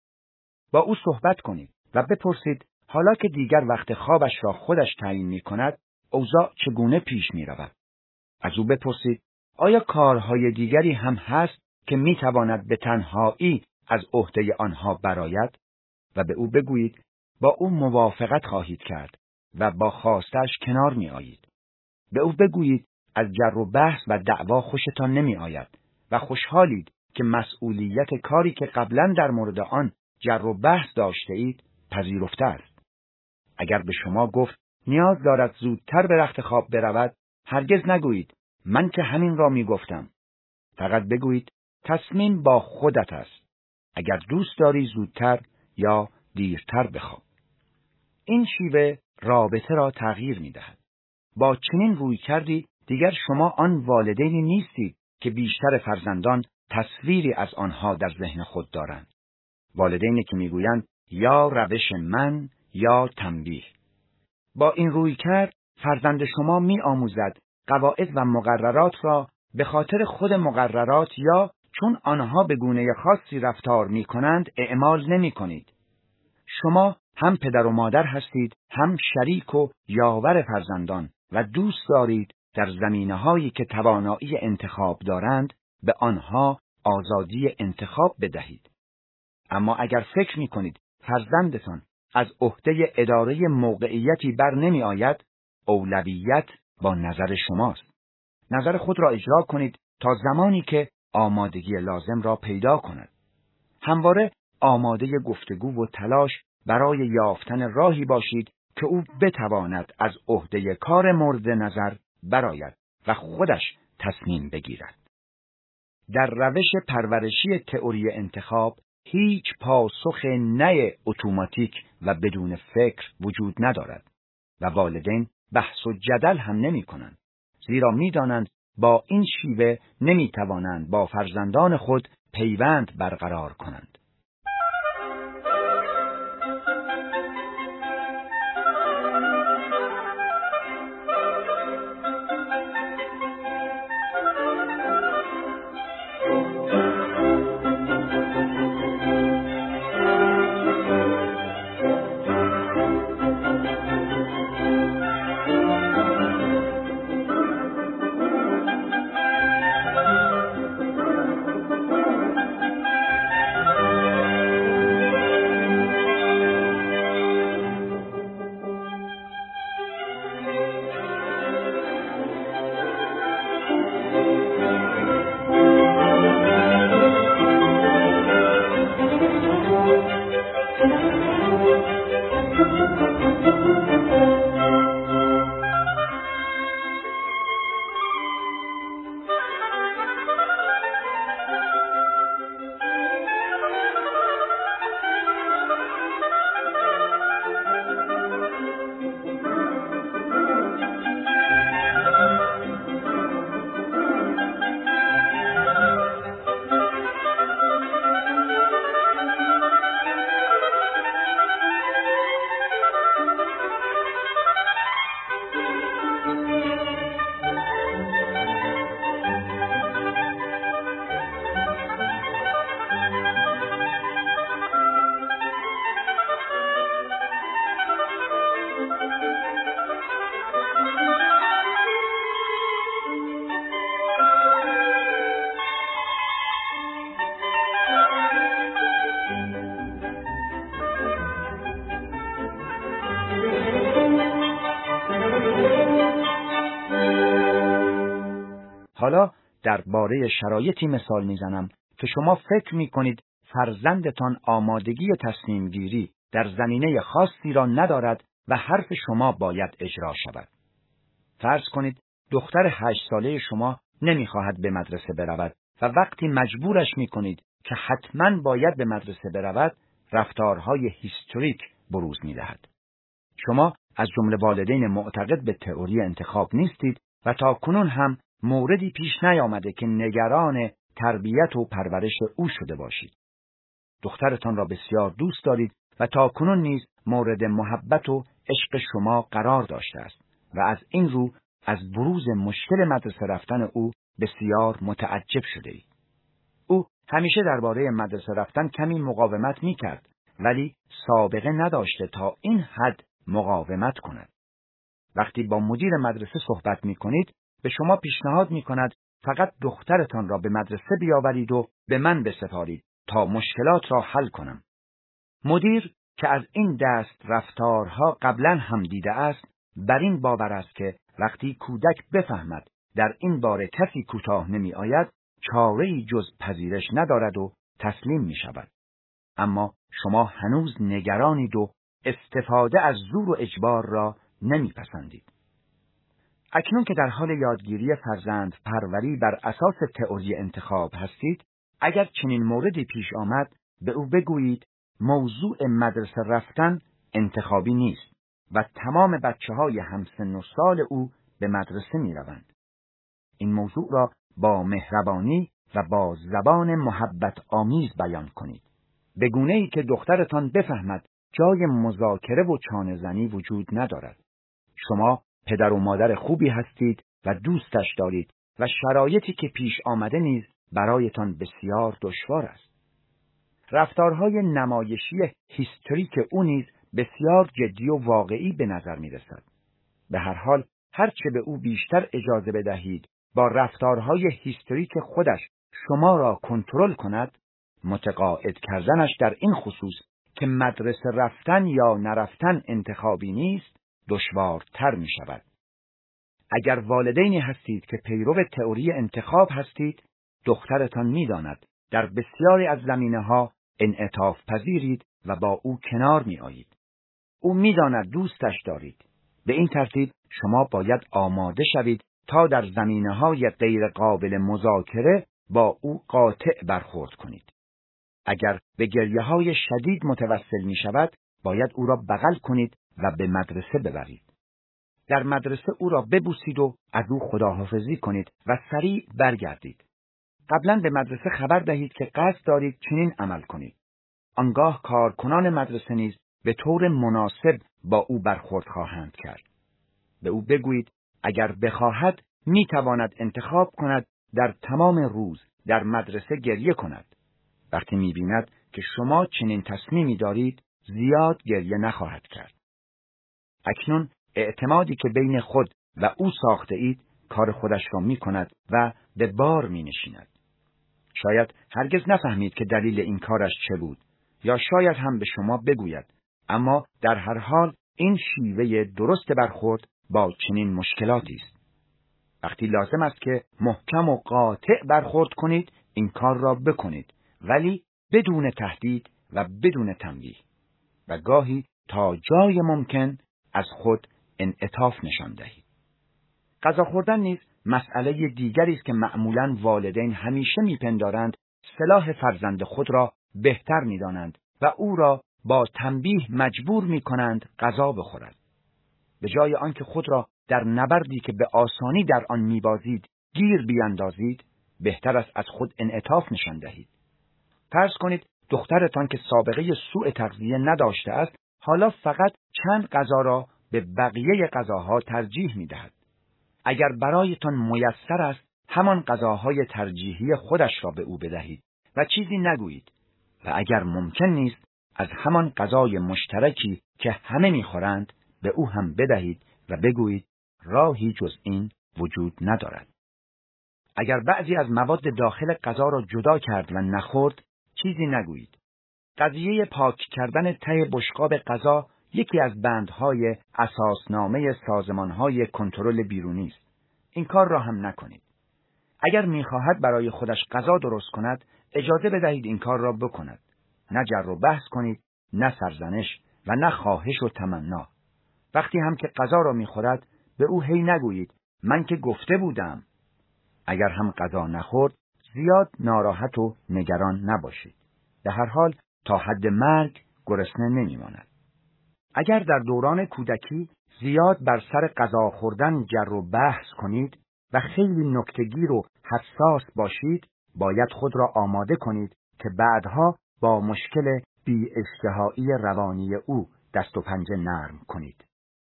با او صحبت کنید و بپرسید حالا که دیگر وقت خوابش را خودش تعیین می کند، اوضاع چگونه پیش می رود؟ از او بپرسید آیا کارهای دیگری هم هست که می تواند به تنهایی از عهده آنها برآید؟ و به او بگویید با او موافقت خواهید کرد و با خواستش کنار می آیید. به او بگویید از جر و بحث و دعوا خوشتان نمی آید و خوشحالید که مسئولیت کاری که قبلا در مورد آن جر و بحث داشته اید پذیرفته است. اگر به شما گفت نیاز دارد زودتر به رخت خواب برود، هرگز نگویید من که همین را می گفتم. فقط بگویید تصمیم با خودت است. اگر دوست داری زودتر یا دیرتر بخواب. این شیوه رابطه را تغییر می دهد. با چنین روی کردی دیگر شما آن والدینی نیستید که بیشتر فرزندان تصویری از آنها در ذهن خود دارند. والدینی که میگویند یا روش من یا تنبیه. با این روی کرد فرزند شما می آموزد قواعد و مقررات را به خاطر خود مقررات یا چون آنها به گونه خاصی رفتار می کنند اعمال نمی کنید. شما هم پدر و مادر هستید، هم شریک و یاور فرزندان و دوست دارید در زمینه‌هایی که توانایی انتخاب دارند به آنها آزادی انتخاب بدهید. اما اگر فکر می کنید فرزندتان از عهده اداره موقعیتی بر نمی آید، اولویت با نظر شماست. نظر خود را اجرا کنید تا زمانی که آمادگی لازم را پیدا کند. همواره آماده گفتگو و تلاش برای یافتن راهی باشید که او بتواند از عهده کار مورد نظر برآید و خودش تصمیم بگیرد. در روش پرورشی تئوری انتخاب هیچ پاسخ نه اتوماتیک و بدون فکر وجود ندارد و والدین بحث و جدل هم نمی کنند، زیرا می دانند با این شیوه نمی توانند با فرزندان خود پیوند برقرار کنند. حالا درباره شرایطی مثال میزنم که شما فکر میکنید فرزندتان آمادگی تصمیم گیری در زمینه خاصی را ندارد و حرف شما باید اجرا شود. فرض کنید دختر هشت ساله شما نمیخواهد به مدرسه برود و وقتی مجبورش میکنید که حتماً باید به مدرسه برود، رفتارهای هیستریک بروز میدهد. شما از جمله والدین معتقد به تئوری انتخاب نیستید و تا کنون هم موردی پیش نیامده که نگران تربیت و پرورش او شده باشید. دخترتان را بسیار دوست دارید و تا کنون نیز مورد محبت و عشق شما قرار داشته است و از این رو از بروز مشکل مدرسه رفتن او بسیار متعجب شده اید. او همیشه درباره مدرسه رفتن کمی مقاومت می کرد، ولی سابقه نداشته تا این حد مقاومت کند. وقتی با مدیر مدرسه صحبت می کنید، به شما پیشنهاد می کند فقط دخترتان را به مدرسه بیاورید و به من بسپارید تا مشکلات را حل کنم. مدیر که از این دست رفتارها قبلا هم دیده است، بر این باور است که وقتی کودک بفهمد در این باره کسی کوتاه نمی آید، چاره‌ای جز پذیرش ندارد و تسلیم می شود. اما شما هنوز نگرانید و استفاده از زور و اجبار را نمی پسندید. اکنون که در حال یادگیری فرزند پروری بر اساس تئوری انتخاب هستید، اگر چنین موردی پیش آمد، به او بگویید موضوع مدرسه رفتن انتخابی نیست و تمام بچه های همسن و سال او به مدرسه می روند. این موضوع را با مهربانی و با زبان محبت آمیز بیان کنید، به گونه‌ای که دخترتان بفهمد جای مذاکره و چانه زنی وجود ندارد. شما پدر و مادر خوبی هستید و دوستش دارید و شرایطی که پیش آمده نیز برایتان بسیار دشوار است. رفتارهای نمایشی هیستریک او نیز بسیار جدی و واقعی به نظر می رسد. به هر حال هرچه به او بیشتر اجازه بدهید با رفتارهای هیستریک خودش شما را کنترل کند، متقاعد کردنش در این خصوص که مدرسه رفتن یا نرفتن انتخابی نیست، دشوارتر می شود. اگر والدینی هستید که پیرو تئوری انتخاب هستید، دخترتان می داند در بسیاری از زمینه‌ها انعطاف پذیرید و با او کنار می آیید. او می داند دوستش دارید. به این ترتیب شما باید آماده شوید تا در زمینه‌های غیر قابل مذاکره با او قاطع برخورد کنید. اگر به گریه‌های شدید متوسل می شود، باید او را بغل کنید و به مدرسه ببرید. در مدرسه او را ببوسید و از او خداحافظی کنید و سریع برگردید. قبلا به مدرسه خبر دهید که قصد دارید چنین عمل کنید. آنگاه کارکنان مدرسه نیز به طور مناسب با او برخورد خواهند کرد. به او بگویید اگر بخواهد می تواند انتخاب کند در تمام روز در مدرسه گریه کند. وقتی می بیند که شما چنین تصمیمی دارید، زیاد گریه نخواهد کرد. اکنون اعتمادی که بین خود و او ساخته اید کار خودش را می کند و به بار می نشیند. شاید هرگز نفهمید که دلیل این کارش چه بود، یا شاید هم به شما بگوید، اما در هر حال این شیوه درست برخورد با چنین مشکلاتی است. وقتی لازم است که محکم و قاطع برخورد کنید، این کار را بکنید، ولی بدون تهدید و بدون تنبیه، و گاهی تا جای ممکن از خود انعطاف نشان دهید. غذا خوردن نیز مسئله دیگری است که معمولاً والدین همیشه میپندارند سلاح فرزند خود را بهتر میدانند و او را با تنبیه مجبور میکنند غذا بخورد. به جای آنکه خود را در نبردی که به آسانی در آن میبازید گیر بیاندازید، بهتر است از خود انعطاف نشان دهید. فرض کنید دخترتان که سابقه سوء تغذیه نداشته است، حالا فقط چند غذا را به بقیه غذاها ترجیح میدهد. اگر برایتان میسر است، همان غذاهای ترجیحی خودش را به او بدهید و چیزی نگویید، و اگر ممکن نیست از همان غذای مشترکی که همه میخورند به او هم بدهید و بگویید راهی جز این وجود ندارد. اگر بعضی از مواد داخل غذا را جدا کرد و نخورد، چیزی نگویید. قضیه پاک کردن ته بشقاب غذا یکی از بندهای اساسنامه سازمانهای کنترل بیرونی است. این کار را هم نکنید. اگر می‌خواهد برای خودش غذا درست کند، اجازه بدهید این کار را بکند. نه جر و بحث کنید، نه سرزنش و نه خواهش و تمنا. وقتی هم که غذا را می‌خورد، به او هی نگویید من که گفته بودم. اگر هم غذا نخورد، زیاد ناراحت و نگران نباشید. به هر حال تا حد مرگ گرسنه نمی‌ماند. اگر در دوران کودکی زیاد بر سر غذا خوردن جر و بحث کنید و خیلی نکته‌گیر و حساس باشید، باید خود را آماده کنید که بعدها با مشکل بی‌اشتهایی روانی او دست و پنجه نرم کنید.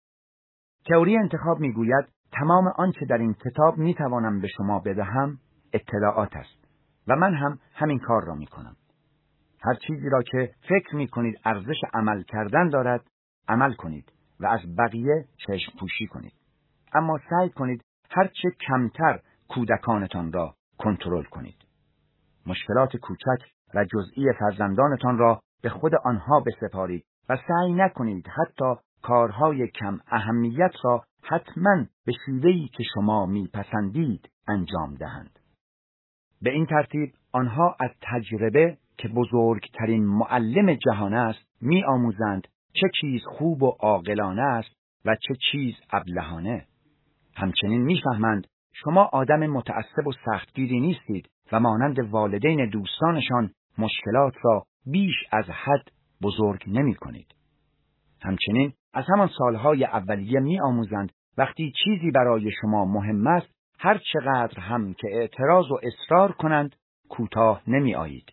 تئوری انتخاب میگوید تمام آنچه در این کتاب میتوانم به شما بدهم اطلاعات است و من هم همین کار را میکنم. هر چیزی را که فکر میکنید ارزش عمل کردن دارد، عمل کنید و از بقیه چشم پوشی کنید. اما سعی کنید هرچه کمتر کودکانتان را کنترل کنید. مشکلات کوچک و جزئی فرزندانتان را به خود آنها بسپارید و سعی نکنید حتی کارهای کم اهمیت را حتماً به شیوهی که شما میپسندید انجام دهند. به این ترتیب آنها از تجربه که بزرگترین معلم جهان است میآموزند چه چیز خوب و عاقلانه است و چه چیز ابلهانه. همچنین میفهمند شما آدم متعصب و سختگیری نیستید و مانند والدین دوستانشان مشکلات را بیش از حد بزرگ نمی کنید. همچنین از همان سالهای اولیه می آموزند وقتی چیزی برای شما مهم است، هر چقدر هم که اعتراض و اصرار کنند، کوتاه نمی آیید.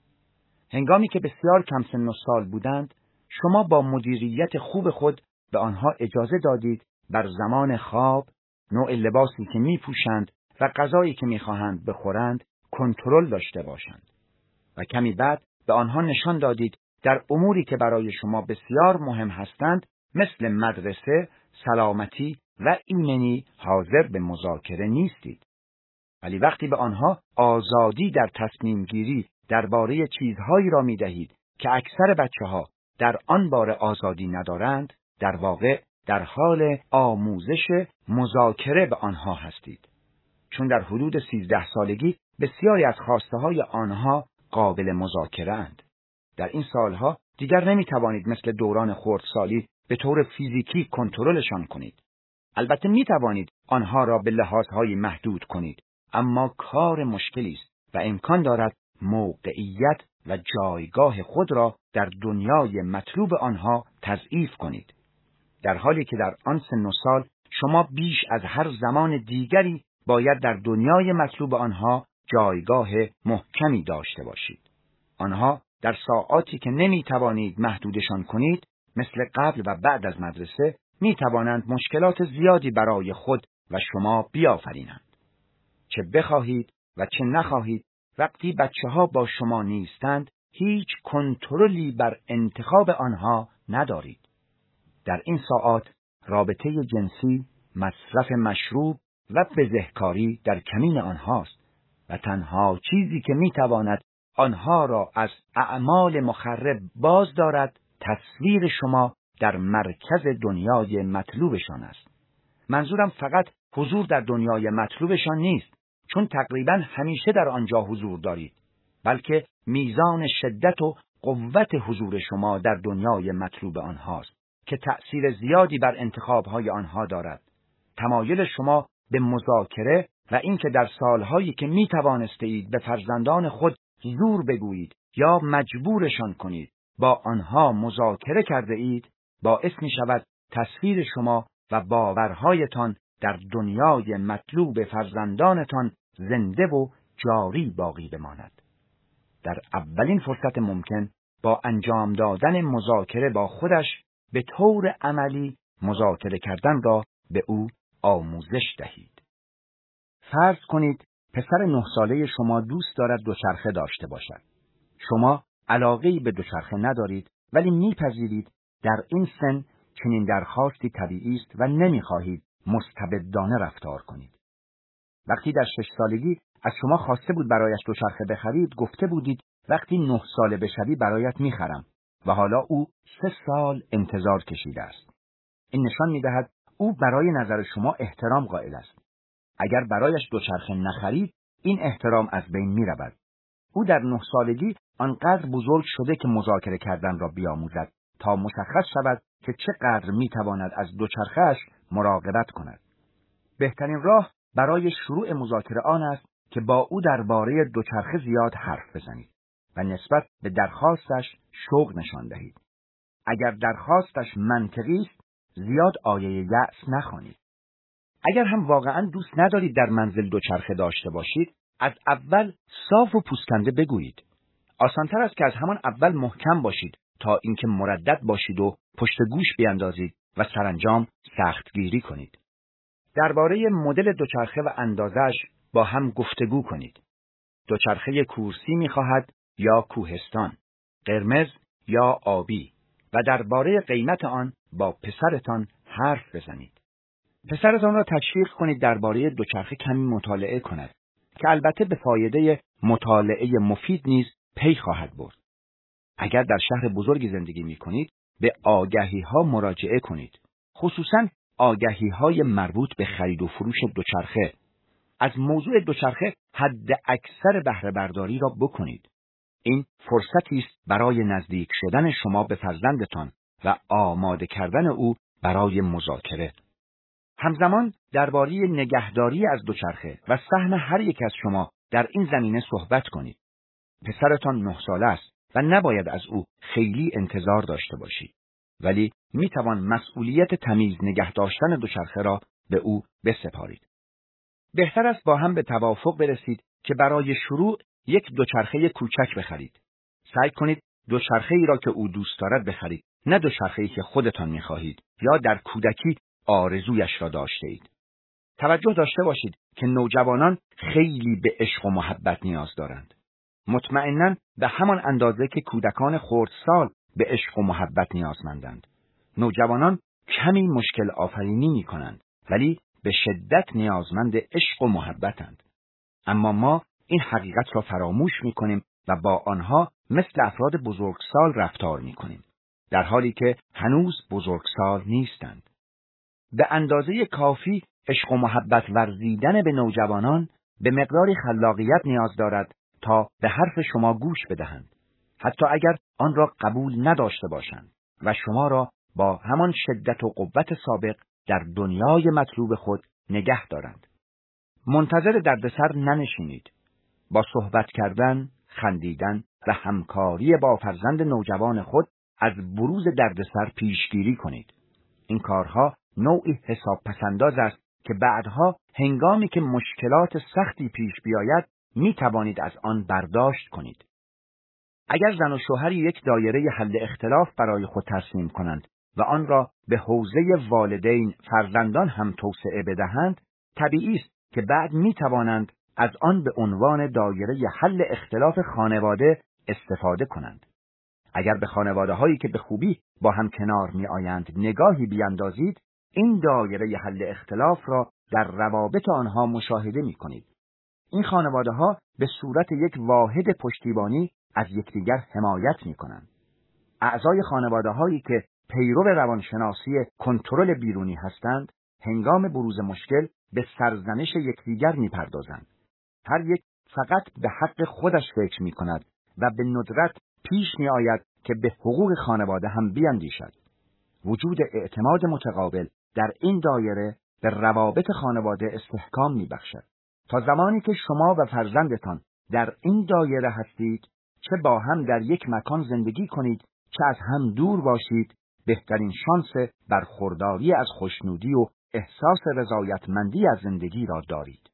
هنگامی که بسیار کم سن و سال بودند، شما با مدیریت خوب خود به آنها اجازه دادید بر زمان خواب، نوع لباسی که می پوشند و غذایی که می خواهند بخورند کنترل داشته باشند. و کمی بعد به آنها نشان دادید در اموری که برای شما بسیار مهم هستند، مثل مدرسه، سلامتی و ایمنی حاضر به مذاکره نیستید. ولی وقتی به آنها آزادی در تصمیم گیری درباره چیزهایی را می دهید که اکثر بچه ها در آن باره آزادی ندارند، در واقع در حال آموزش مذاکره به آنها هستید. چون در حدود سیزده سالگی بسیاری از خواسته های آنها قابل مذاکره اند. در این سالها دیگر نمی توانید مثل دوران خردسالی به طور فیزیکی کنترلشان کنید. البته می توانید آنها را به لحاظهای محدود کنید، اما کار مشکلی است و امکان دارد موقعیت و جایگاه خود را در دنیای مطلوب آنها تضعیف کنید. در حالی که در آن سن و سال شما بیش از هر زمان دیگری باید در دنیای مطلوب آنها جایگاه محکمی داشته باشید. آنها در ساعاتی که نمی توانید محدودشان کنید، مثل قبل و بعد از مدرسه، می توانند مشکلات زیادی برای خود و شما بیافرینند. چه بخواهید و چه نخواهید، وقتی بچه ها با شما نیستند، هیچ کنترلی بر انتخاب آنها ندارید. در این ساعات رابطه جنسی، مصرف مشروب و بزهکاری در کمین آنهاست و تنها چیزی که میتواند آنها را از اعمال مخرب باز دارد تصویر شما در مرکز دنیای مطلوبشان است. منظورم فقط حضور در دنیای مطلوبشان نیست، چون تقریبا همیشه در آنجا حضور دارید، بلکه میزان شدت و قوت حضور شما در دنیای مطلوب آنهاست که تأثیر زیادی بر انتخابهای آنها دارد. تمایل شما به مذاکره و اینکه در سالهایی که می توانستید به فرزندان خود زور بگویید یا مجبورشان کنید با آنها مذاکره کرده اید، باعث می شود تصویر شما و باورهایتان در دنیای مطلوب فرزندانتان زنده و جاری باقی بماند. در اولین فرصت ممکن با انجام دادن مذاکره با خودش به طور عملی مذاکره کردن را به او آموزش دهید. فرض کنید پسر نه ساله شما دوست دارد دوچرخه داشته باشد. شما علاقه‌ای به دوچرخه ندارید، ولی میپذیرید در این سن چنین درخواستی طبیعی است و نمیخواهید مستبدانه رفتار کنید. وقتی در شش سالگی از شما خواسته بود برایش دوچرخه بخرید، گفته بودید وقتی نه ساله بشوی برایت میخرم و حالا او سه سال انتظار کشیده است. این نشان میدهد او برای نظر شما احترام قائل است. اگر برایش دوچرخه نخرید، این احترام از بین می رود. او در نه سالگی آنقدر بزرگ شده که مذاکره کردن را بیاموزد تا مشخص شود که چقدر می تواند از دوچرخه‌اش مراقبت کند. بهترین راه برای شروع مذاکره آن است که با او درباره دوچرخه زیاد حرف بزنید و نسبت به درخواستش شوق نشان دهید. اگر درخواستش منطقی است، زیاد آیه یأس نخوانید. اگر هم واقعاً دوست ندارید در منزل دوچرخه داشته باشید، از اول صاف و پوسکنده بگویید. آسان‌تر است که از همان اول محکم باشید تا اینکه مردد باشید و پشت گوش بیاندازید و سرانجام سختگیری کنید. درباره مدل دوچرخه و اندازش با هم گفتگو کنید. دوچرخه کورسی می‌خواهد یا کوهستان، قرمز یا آبی و درباره قیمت آن با پسرتان حرف بزنید. پسرتان را تشویق کنید درباره دوچرخه کمی مطالعه کند که البته به فایده مطالعه مفید نیز پی خواهد برد. اگر در شهر بزرگی زندگی می‌کنید، به آگهی‌ها مراجعه کنید، خصوصاً آگهی‌های مربوط به خرید و فروش دوچرخه. از موضوع دوچرخه حد اکثر بهره برداری را بکنید. این فرصتی است برای نزدیک شدن شما به فرزندتان و آماده کردن او برای مذاکره. همزمان درباره نگهداری از دوچرخه و سهم هر یک از شما در این زمینه صحبت کنید. پسرتان نه ساله است و نباید از او خیلی انتظار داشته باشید، ولی می توان مسئولیت تمیز نگه داشتن دوچرخه را به او بسپارید. بهتر است با هم به توافق برسید که برای شروع یک دوچرخه کوچک بخرید. سعی کنید دوچرخه ای را که او دوست دارد بخرید، نه دوچرخه ای که خودتان می خواهید یا در کودکی آرزویش را داشته اید. توجه داشته باشید که نوجوانان خیلی به عشق و محبت نیاز دارند. مطمئناً به همان اندازه که کودکان خردسال به عشق و محبت نیازمندند. نوجوانان کمی مشکل آفرینی می کنند، ولی به شدت نیازمند عشق و محبتند. اما ما این حقیقت را فراموش می کنیم و با آنها مثل افراد بزرگسال رفتار می کنیم، در حالی که هنوز بزرگسال نیستند. به اندازه کافی عشق و محبت ورزیدن به نوجوانان به مقداری خلاقیت نیاز دارد تا به حرف شما گوش بدهند، حتی اگر آن را قبول نداشته باشند و شما را با همان شدت و قوت سابق در دنیای مطلوب خود نگه دارند. منتظر دردسر ننشینید. با صحبت کردن، خندیدن و همکاری با فرزند نوجوان خود از بروز دردسر پیشگیری کنید. این کارها نوعی حساب پسنداز است که بعدها هنگامی که مشکلات سختی پیش بیاید می توانید از آن برداشت کنید. اگر زن و شوهر یک دایره حل اختلاف برای خود ترسیم کنند و آن را به حوزه والدین فرزندان هم توسعه بدهند، طبیعی است که بعد می توانند از آن به عنوان دایره حل اختلاف خانواده استفاده کنند. اگر به خانواده هایی که به خوبی با هم کنار می آیند نگاهی بیاندازید، این دایره حل اختلاف را در روابط آنها مشاهده می کنید. این خانواده ها به صورت یک واحد پشتیبانی از یکدیگر حمایت می کنند. اعضای خانواده هایی که پیرو روانشناسی کنترل بیرونی هستند، هنگام بروز مشکل به سرزنش یکدیگر می پردازند. هر یک فقط به حق خودش فکر می کند و به ندرت پیش می آید که به حقوق خانواده هم بیاندیشد. وجود اعتماد متقابل در این دایره به روابط خانواده استحکام می بخشد. تا زمانی که شما و فرزندتان در این دایره هستید، چه با هم در یک مکان زندگی کنید، چه از هم دور باشید، بهترین شانس برخورداری از خوشنودی و احساس رضایتمندی از زندگی را دارید.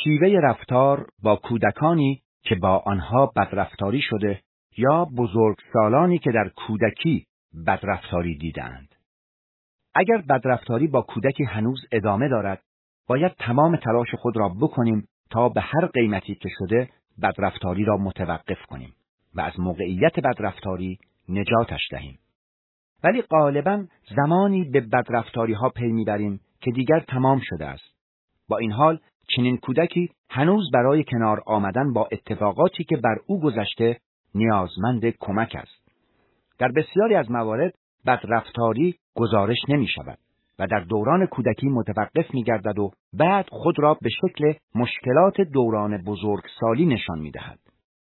شیوه رفتار با کودکانی که با آنها بدرفتاری شده یا بزرگسالانی که در کودکی بدرفتاری دیدند. اگر بدرفتاری با کودکی هنوز ادامه دارد، باید تمام تلاش خود را بکنیم تا به هر قیمتی که شده بدرفتاری را متوقف کنیم و از موقعیت بدرفتاری نجاتش دهیم. ولی غالباً زمانی به بدرفتاری ها پی میبریم که دیگر تمام شده است. با این حال چنین کودکی هنوز برای کنار آمدن با اتفاقاتی که بر او گذشته نیازمند کمک است. در بسیاری از موارد بدرفتاری گزارش نمی شود و در دوران کودکی متوقف می گردد و بعد خود را به شکل مشکلات دوران بزرگسالی نشان می دهد.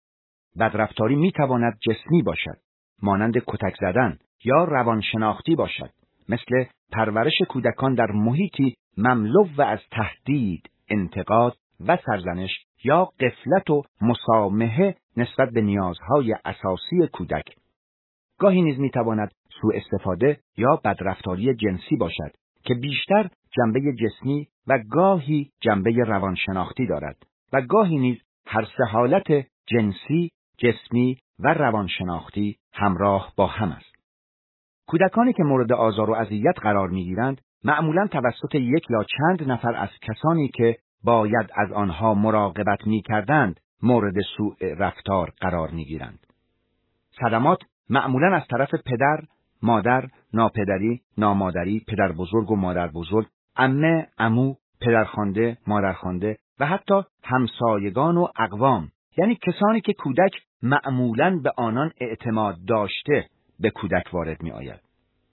بدرفتاری می تواند جسمی باشد، مانند کتک زدن، یا روانشناختی باشد، مثل پرورش کودکان در محیطی مملو و از تهدید، انتقاد و سرزنش یا غفلت و مسامحه نسبت به نیازهای اساسی کودک. گاهی نیز میتواند سوء استفاده یا بدرفتاری جنسی باشد که بیشتر جنبه جسمی و گاهی جنبه روانشناختی دارد و گاهی نیز هر سه حالت جنسی، جسمی و روانشناختی همراه با هم است. کودکانی که مورد آزار و اذیت قرار میگیرند معمولاً توسط یک یا چند نفر از کسانی که باید از آنها مراقبت میکردند مورد سوء رفتار قرار میگیرند. صدمات معمولاً از طرف پدر، مادر، ناپدری، نامادری، پدر بزرگ و مادر بزرگ، عمه، عمو، پدرخوانده، مادرخوانده و حتی همسایگان و اقوام، یعنی کسانی که کودک معمولاً به آنان اعتماد داشته به کودک وارد می آید.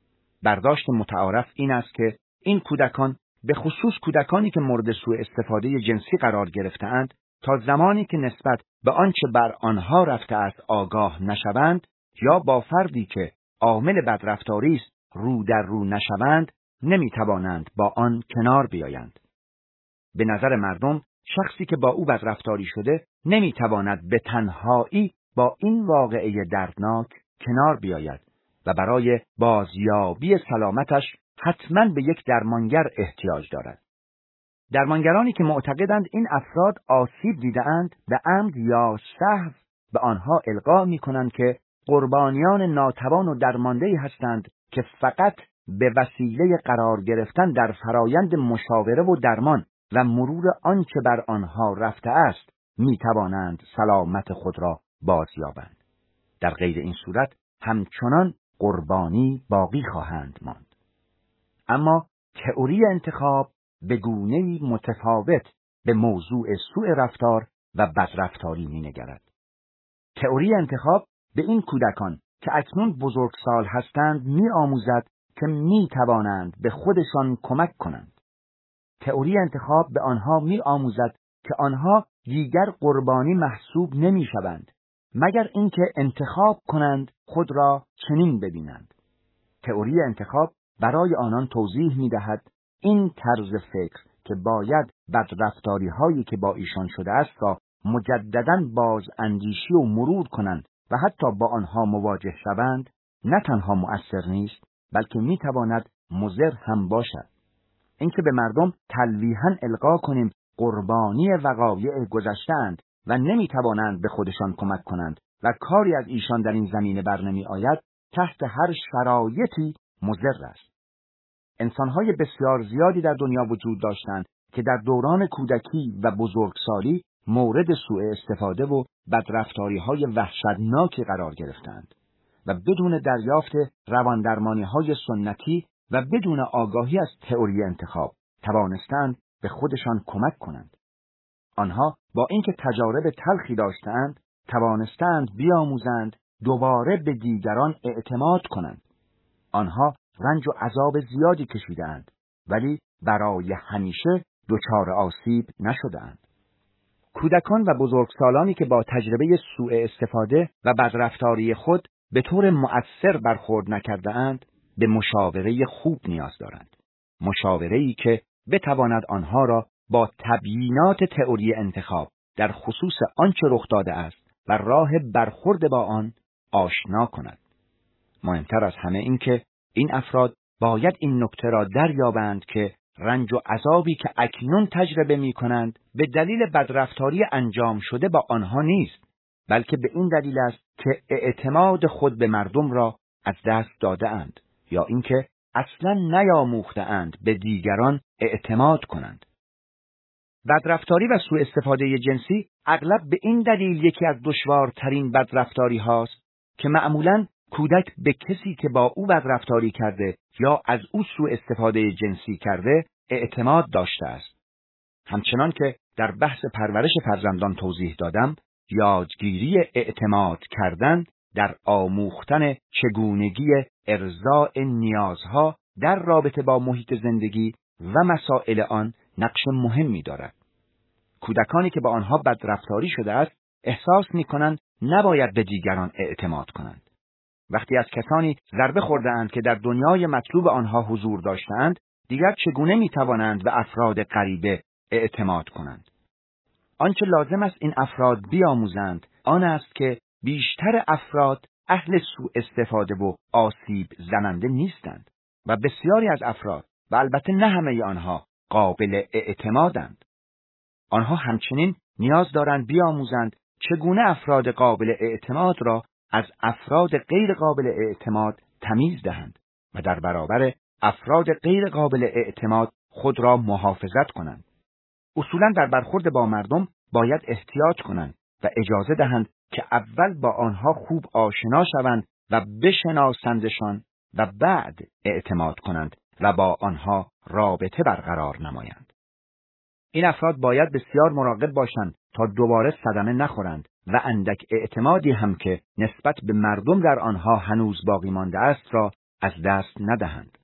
برداشت متعارف این است که این کودکان، به خصوص کودکانی که مورد سوء استفاده جنسی قرار گرفته‌اند، تا زمانی که نسبت به آنچه بر آنها رفته است آگاه نشوند یا با فردی که عامل بدرفتاری است رو در رو نشوند، نمی‌توانند با آن کنار بیایند. به نظر مردم شخصی که با او بدرفتاری شده نمی‌تواند به تنهایی با این واقعه دردناک کنار بیاید و برای بازیابی سلامتش حتماً به یک درمانگر احتیاج دارد. درمانگرانی که معتقدند این افراد آسیب دیده‌اند به عمد یا سهو به آنها القا می‌کنند که قربانیان ناتوان و درمانده‌ای هستند که فقط به وسیله قرار گرفتن در فرایند مشاوره و درمان و مرور آنچه بر آنها رفته است می‌توانند سلامت خود را بازیابند. در غیر این صورت همچنان قربانی باقی خواهند ماند. اما تئوری انتخاب به گونه‌ای متفاوت به موضوع سوء رفتار و بدرفتاری می‌نگرد. تئوری انتخاب به این کودکان که اکنون بزرگسال هستند می‌آموزد که می‌توانند به خودشان کمک کنند. تئوری انتخاب به آنها می‌آموزد که آنها دیگر قربانی محسوب نمی‌شوند مگر اینکه انتخاب کنند خود را چنین ببینند. تئوری انتخاب برای آنان توضیح می‌دهد این طرز فکر که باید بدرفتاری هایی که با ایشان شده است را مجدداً باز اندیشی و مرور کنند و حتی با آنها مواجه شوند، نه تنها مؤثر نیست بلکه می‌تواند مضر هم باشد. اینکه به مردم تلویحاً القا کنیم قربانی وقایع گذشته‌اند و نمی‌توانند به خودشان کمک کنند و کاری از ایشان در این زمینه بر نمی آید، تحت هر شرایطی مضر است. انسان‌های بسیار زیادی در دنیا وجود داشتند که در دوران کودکی و بزرگسالی مورد سوء استفاده و بدرفتاری‌های وحشتناکی قرار گرفتند و بدون دریافت رواندرمانی‌های سنتی و بدون آگاهی از تئوری انتخاب توانستند به خودشان کمک کنند. آنها با اینکه تجارب تلخی داشتند، توانستند بیاموزند دوباره به دیگران اعتماد کنند. آنها رنج و عذاب زیادی کشیدند ولی برای همیشه دچار آسیب نشدند. کودکان و بزرگسالانی که با تجربه سوء استفاده و بدرفتاری خود به طور مؤثر برخورد نکرده‌اند، به مشاوره خوب نیاز دارند. مشاوره‌ای که بتواند آنها را با تبیینات تئوری انتخاب در خصوص آنچه رخ داده است و راه برخورد با آن آشنا کند. مهمتر از همه این که این افراد باید این نکته را دریابند که رنج و عذابی که اکنون تجربه می کنند به دلیل بدرفتاری انجام شده با آنها نیست، بلکه به این دلیل است که اعتماد خود به مردم را از دست داده اند یا اینکه اصلا نیاموخته اند به دیگران اعتماد کنند. بدرفتاری و سوء استفاده جنسی اغلب به این دلیل یکی از دشوارترین بدرفتاری هاست که معمولاً کودک به کسی که با او بدرفتاری کرده یا از او سوء استفاده جنسی کرده اعتماد داشته است. همچنان که در بحث پرورش فرزندان توضیح دادم، یادگیری اعتماد کردن در آموختن چگونگی ارضاء نیازها در رابطه با محیط زندگی و مسائل آن نقش مهمی دارد. کودکانی که با آنها بدرفتاری شده است احساس می‌کنند نباید به دیگران اعتماد کنند. وقتی از کسانی ضربه خورده‌اند که در دنیای مطلوب آنها حضور داشتند، دیگر چگونه می‌توانند به افراد غریبه اعتماد کنند؟ آنچه لازم است این افراد بیاموزند آن است که بیشتر افراد اهل سوء استفاده و آسیب زننده نیستند و بسیاری از افراد و البته نه همه آنها قابل اعتمادند. آنها همچنین نیاز دارند بیاموزند چگونه افراد قابل اعتماد را از افراد غیر قابل اعتماد تمیز دهند و در برابر افراد غیر قابل اعتماد خود را محافظت کنند. اصولاً در برخورد با مردم باید احتیاط کنند و اجازه دهند که اول با آنها خوب آشنا شوند و بشناسندشان و بعد اعتماد کنند و با آنها رابطه برقرار نمایند. این افراد باید بسیار مراقب باشند تا دوباره صدمه نخورند و اندک اعتمادی هم که نسبت به مردم در آنها هنوز باقی مانده است را از دست ندهند.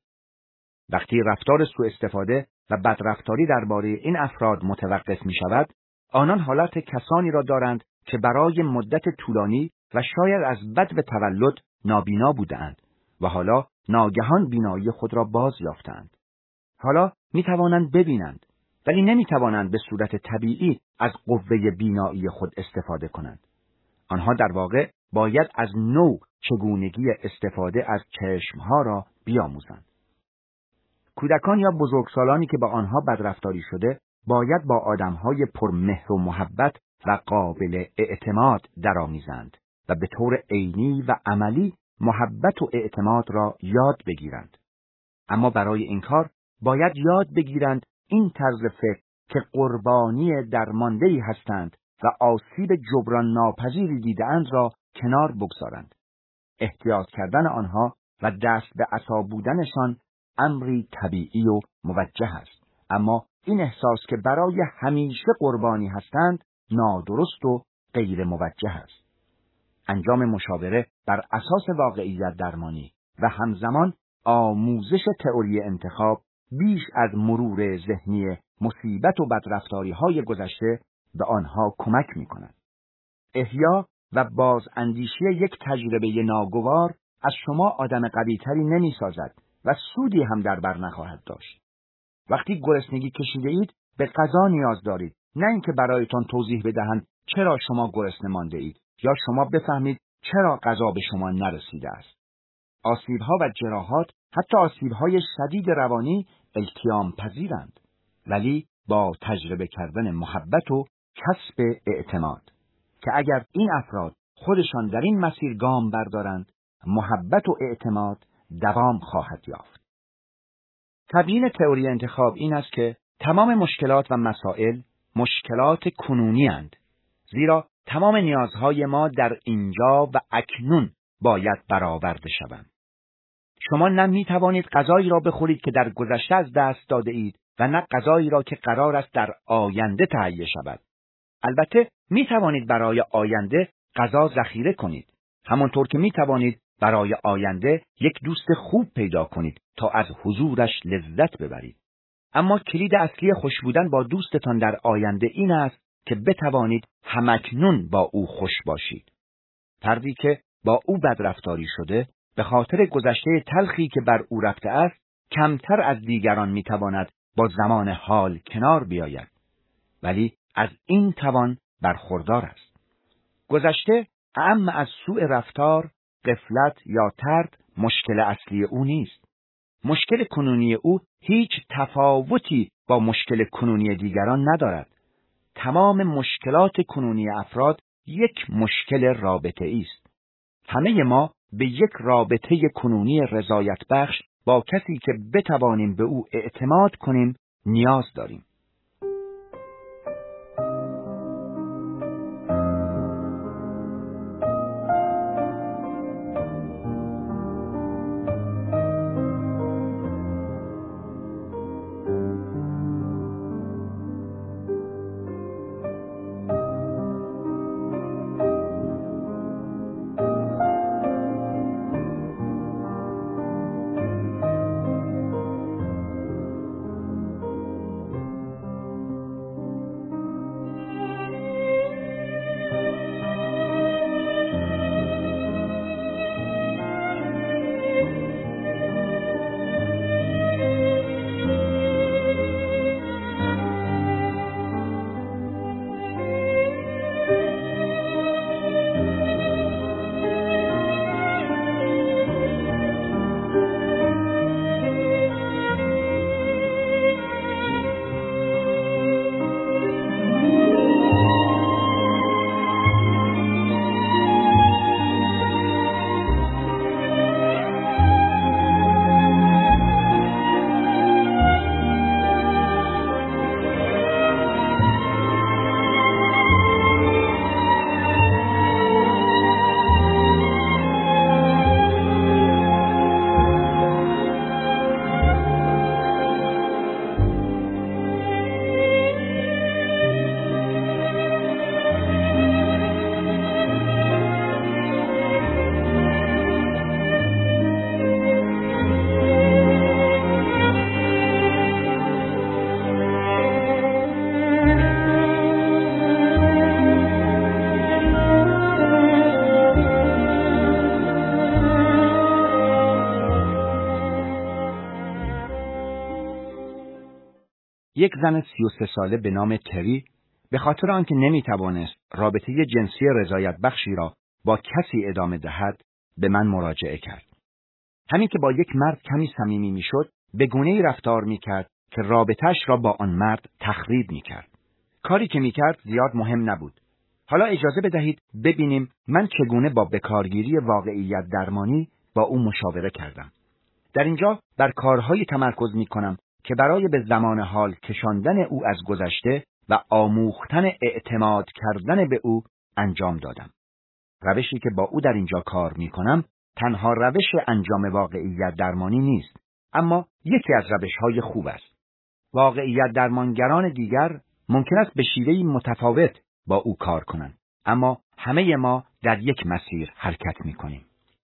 وقتی رفتار سوء استفاده و بدرفتاری درباره این افراد متوقف می شود، آنان حالت کسانی را دارند که برای مدت طولانی و شاید از بد و تولد نابینا بودند و حالا ناگهان بینایی خود را باز یافتند. حالا می توانند ببینند، ولی نمی توانند به صورت طبیعی از قوه بینایی خود استفاده کنند. آنها در واقع باید از نو چگونگی استفاده از چشمها را بیاموزند. کودکان یا بزرگسالانی که با آنها بدرفتاری شده باید با آدمهای پرمهر و محبت و قابل اعتماد درآمیزند و به طور عینی و عملی محبت و اعتماد را یاد بگیرند. اما برای این کار باید یاد بگیرند این طرز فکر که قربانی درمانده‌ای هستند و آسیب جبران ناپذیری دیده‌اند را کنار بگذارند. احتیاط کردن آنها و دست به عصا بودنشان امری طبیعی و موجه است، اما این احساس که برای همیشه قربانی هستند نادرست و غیر موجه است. انجام مشاوره بر اساس واقعیت درمانی و همزمان آموزش تئوری انتخاب بیش از مرور ذهنی مصیبت و بدرفتاری های گذشته به آنها کمک می کند. احیا و باز اندیشی یک تجربه ناگوار از شما آدم قوی‌تری نمی سازد و سودی هم در بر نخواهد داشت. وقتی گرسنگی کشیده اید به غذا نیاز دارید، نه اینکه برایتان توضیح بدهند چرا شما گرسنه مانده اید یا شما بفهمید چرا غذا به شما نرسیده است. آسیب‌ها و جراحات، حتی آسیب‌های شدید روانی التیام پذیرند، ولی با تجربه کردن محبت و کسب اعتماد که اگر این افراد خودشان در این مسیر گام بردارند، محبت و اعتماد دوام خواهد یافت. تبیین تئوری انتخاب این است که تمام مشکلات و مسائل مشکلات کنونی اند، زیرا تمام نیازهای ما در اینجا و اکنون باید برآورده شوند. شما نه می توانید غذایی را بخورید که در گذشته از دست داده اید و نه غذایی را که قرار است در آینده تهیه شود. البته می توانید برای آینده غذا ذخیره کنید، همانطور که می توانید برای آینده یک دوست خوب پیدا کنید تا از حضورش لذت ببرید. اما کلید اصلی خوش بودن با دوستتان در آینده این است که بتوانید همکنون با او خوش باشید. فردی که با او بدرفتاری شده به خاطر گذشته تلخی که بر او رفته است کمتر از دیگران میتواند با زمان حال کنار بیاید، ولی از این توان برخوردار است. گذشته اعم از سوء رفتار، غفلت یا ترد مشکل اصلی او نیست. مشکل کنونی او هیچ تفاوتی با مشکل کنونی دیگران ندارد. تمام مشکلات کنونی افراد یک مشکل رابطه‌ای است. همه ما به یک رابطه کنونی رضایت بخش با کسی که بتوانیم به او اعتماد کنیم نیاز داریم. یک زن سی و سه ساله به نام تری به خاطر آنکه نمیتوانست رابطه جنسی رضایت بخشی را با کسی ادامه دهد به من مراجعه کرد. همین که با یک مرد کمی صمیمی میشد، به گونه‌ای رفتار میکرد که رابطه‌اش را با آن مرد تخریب میکرد. کاری که میکرد زیاد مهم نبود. حالا اجازه بدهید ببینیم من چگونه با بکارگیری واقعیت درمانی با او مشاوره کردم. در اینجا بر کارهایی تمرکز میکنم که برای به زمان حال کشاندن او از گذشته و آموختن اعتماد کردن به او انجام دادم. روشی که با او در اینجا کار میکنم تنها روش انجام واقعیت درمانی نیست، اما یکی از روشهای خوب است. واقعیت درمانگران دیگر ممکن است به شیوهی متفاوت با او کار کنند، اما همه ما در یک مسیر حرکت میکنیم.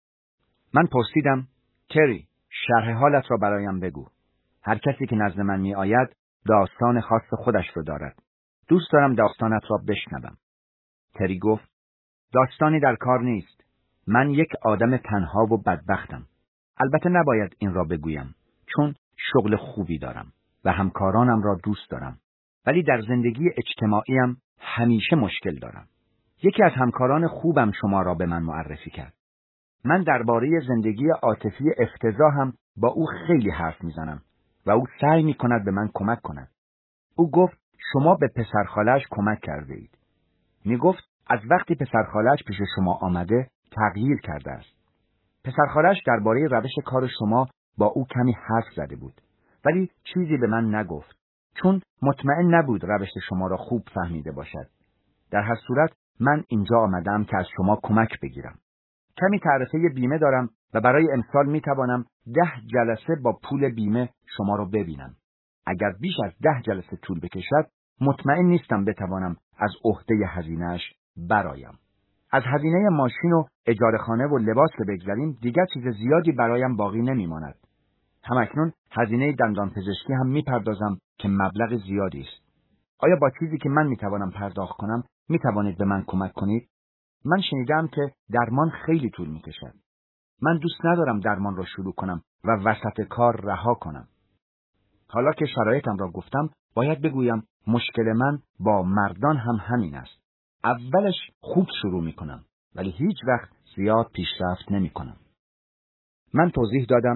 من پرسیدم: تری، شرح حالت را برایم بگو. هر کسی که نزد من می آید داستان خاص خودش رو دارد. دوست دارم داستانت را بشنوم. تری گفت: داستانی در کار نیست. من یک آدم تنها و بدبختم. البته نباید این را بگویم، چون شغل خوبی دارم و همکارانم را دوست دارم. ولی در زندگی اجتماعیم همیشه مشکل دارم. یکی از همکاران خوبم شما را به من معرفی کرد. من درباره زندگی عاطفی افتضاح هم با او خیلی حرف میزنم و او سعی میکند به من کمک کند. او گفت شما به پسرخاله‌اش کمک کرده اید. میگفت از وقتی پسرخاله‌اش پیش شما آمده تغییر کرده است. پسرخاله‌اش درباره روش کار شما با او کمی حرف زده بود، ولی چیزی به من نگفت، چون مطمئن نبود روش شما را خوب فهمیده باشد. در هر صورت من اینجا آمدم که از شما کمک بگیرم. کمی تعرفه بیمه دارم و برای امسال می توانم ده جلسه با پول بیمه شما را ببینم. اگر بیش از ده جلسه طول بکشد، مطمئن نیستم بتوانم از عهده هزینه‌اش برایم. از هزینه ماشین و اجاره خانه و لباس که بگذاریم، دیگر چیز زیادی برایم باقی نمی ماند. همکنون هزینه دندان پزشکی هم می پردازم که مبلغ زیادی است. آیا با چیزی که من می توانم پرداخت کنم می توانید به من کمک کنید؟ من شنیدم که درمان خیلی طول می کشد. من دوست ندارم درمان را شروع کنم و وسط کار رها کنم. حالا که شرایطم را گفتم، باید بگویم مشکل من با مردان هم همین است. اولش خوب شروع می کنم، ولی هیچ وقت زیاد پیشرفت نمی کنم. من توضیح دادم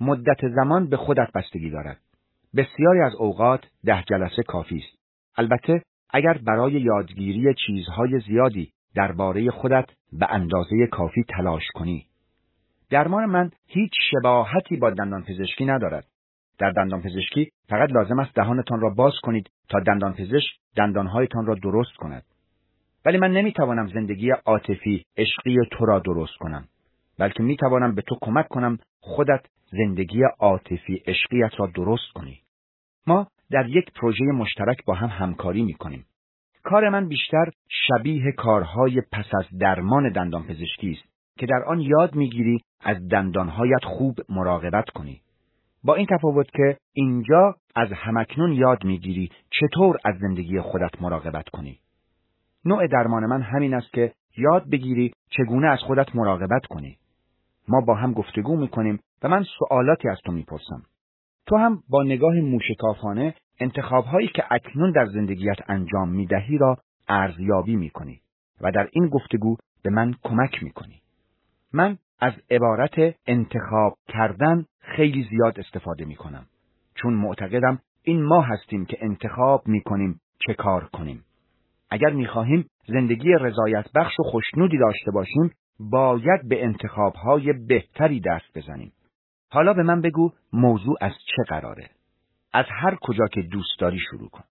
مدت زمان به خودت بستگی دارد. بسیاری از اوقات ده جلسه کافی است. البته اگر برای یادگیری چیزهای زیادی درباره خودت به اندازه کافی تلاش کنی. درمان من هیچ شباهتی با دندانپزشکی ندارد. در دندانپزشکی فقط لازم است دهانتان را باز کنید تا دندانپزشک دندانهایتان را درست کند. ولی من نمیتوانم زندگی عاطفی عشقی تو را درست کنم، بلکه میتوانم به تو کمک کنم خودت زندگی عاطفی عشقیت را درست کنی. ما در یک پروژه مشترک با هم همکاری میکنیم. کار من بیشتر شبیه کارهای پس از درمان دندانپزشکی است که در آن یاد میگیری از دندانهایت خوب مراقبت کنی. با این تفاوت که اینجا از همکنون یاد میگیری چطور از زندگی خودت مراقبت کنی. نوع درمان من همین است که یاد بگیری چگونه از خودت مراقبت کنی. ما با هم گفتگو میکنیم و من سوالاتی از تو میپرسم. تو هم با نگاه موشکافانه انتخاب‌هایی که اکنون در زندگیت انجام میدهی را ارزیابی میکنی و در این گفتگو به من کمک میکنی. من از عبارت انتخاب کردن خیلی زیاد استفاده میکنم، چون معتقدم این ما هستیم که انتخاب میکنیم چه کار کنیم. اگر میخواهیم زندگی رضایت بخش و خوشنودی داشته باشیم، باید به انتخاب‌های بهتری دست بزنیم. حالا به من بگو موضوع از چه قراره؟ از هر کجا که دوست داری شروع کن.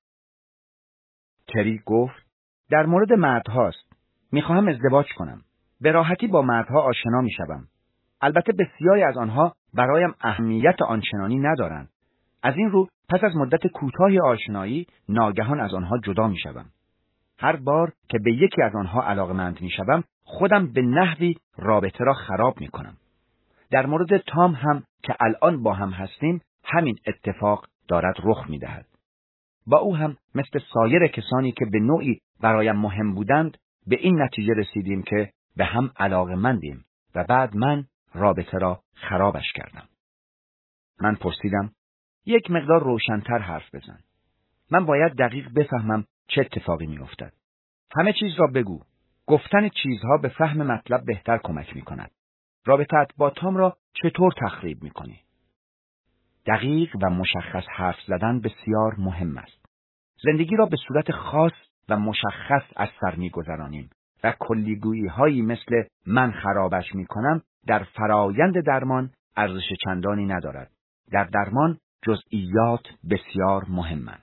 تری گفت در مورد مردهاست. میخواهم ازدواج کنم. به راحتی با مردها آشنا میشوم. البته بسیاری از آنها برایم اهمیت آنچنانی ندارند. از این رو پس از مدت کوتاهی آشنایی ناگهان از آنها جدا میشوم. هر بار که به یکی از آنها علاقمند میشوم، خودم به نحوی رابطه را خراب میکنم. در مورد تام هم که الان با هم هستیم، همین اتفاق دارد رخ میدهد. با او هم مثل سایر کسانی که به نوعی برایم مهم بودند، به این نتیجه رسیدیم که به هم علاقمندیم و بعد من رابطه را خرابش کردم. من پرسیدم یک مقدار روشن‌تر حرف بزن. من باید دقیق بفهمم چه اتفاقی می‌افتد. همه چیز را بگو. گفتن چیزها به فهم مطلب بهتر کمک می‌کند. رابطه‌ات با تام را چطور تخریب می‌کنی؟ دقیق و مشخص حرف زدن بسیار مهم است. زندگی را به صورت خاص و مشخص از سر می‌گذرانیم و کلیگویی‌هایی مثل من خرابش می‌کنم در فرایند درمان ارزش چندانی ندارد. در درمان جزئیات بسیار مهمند.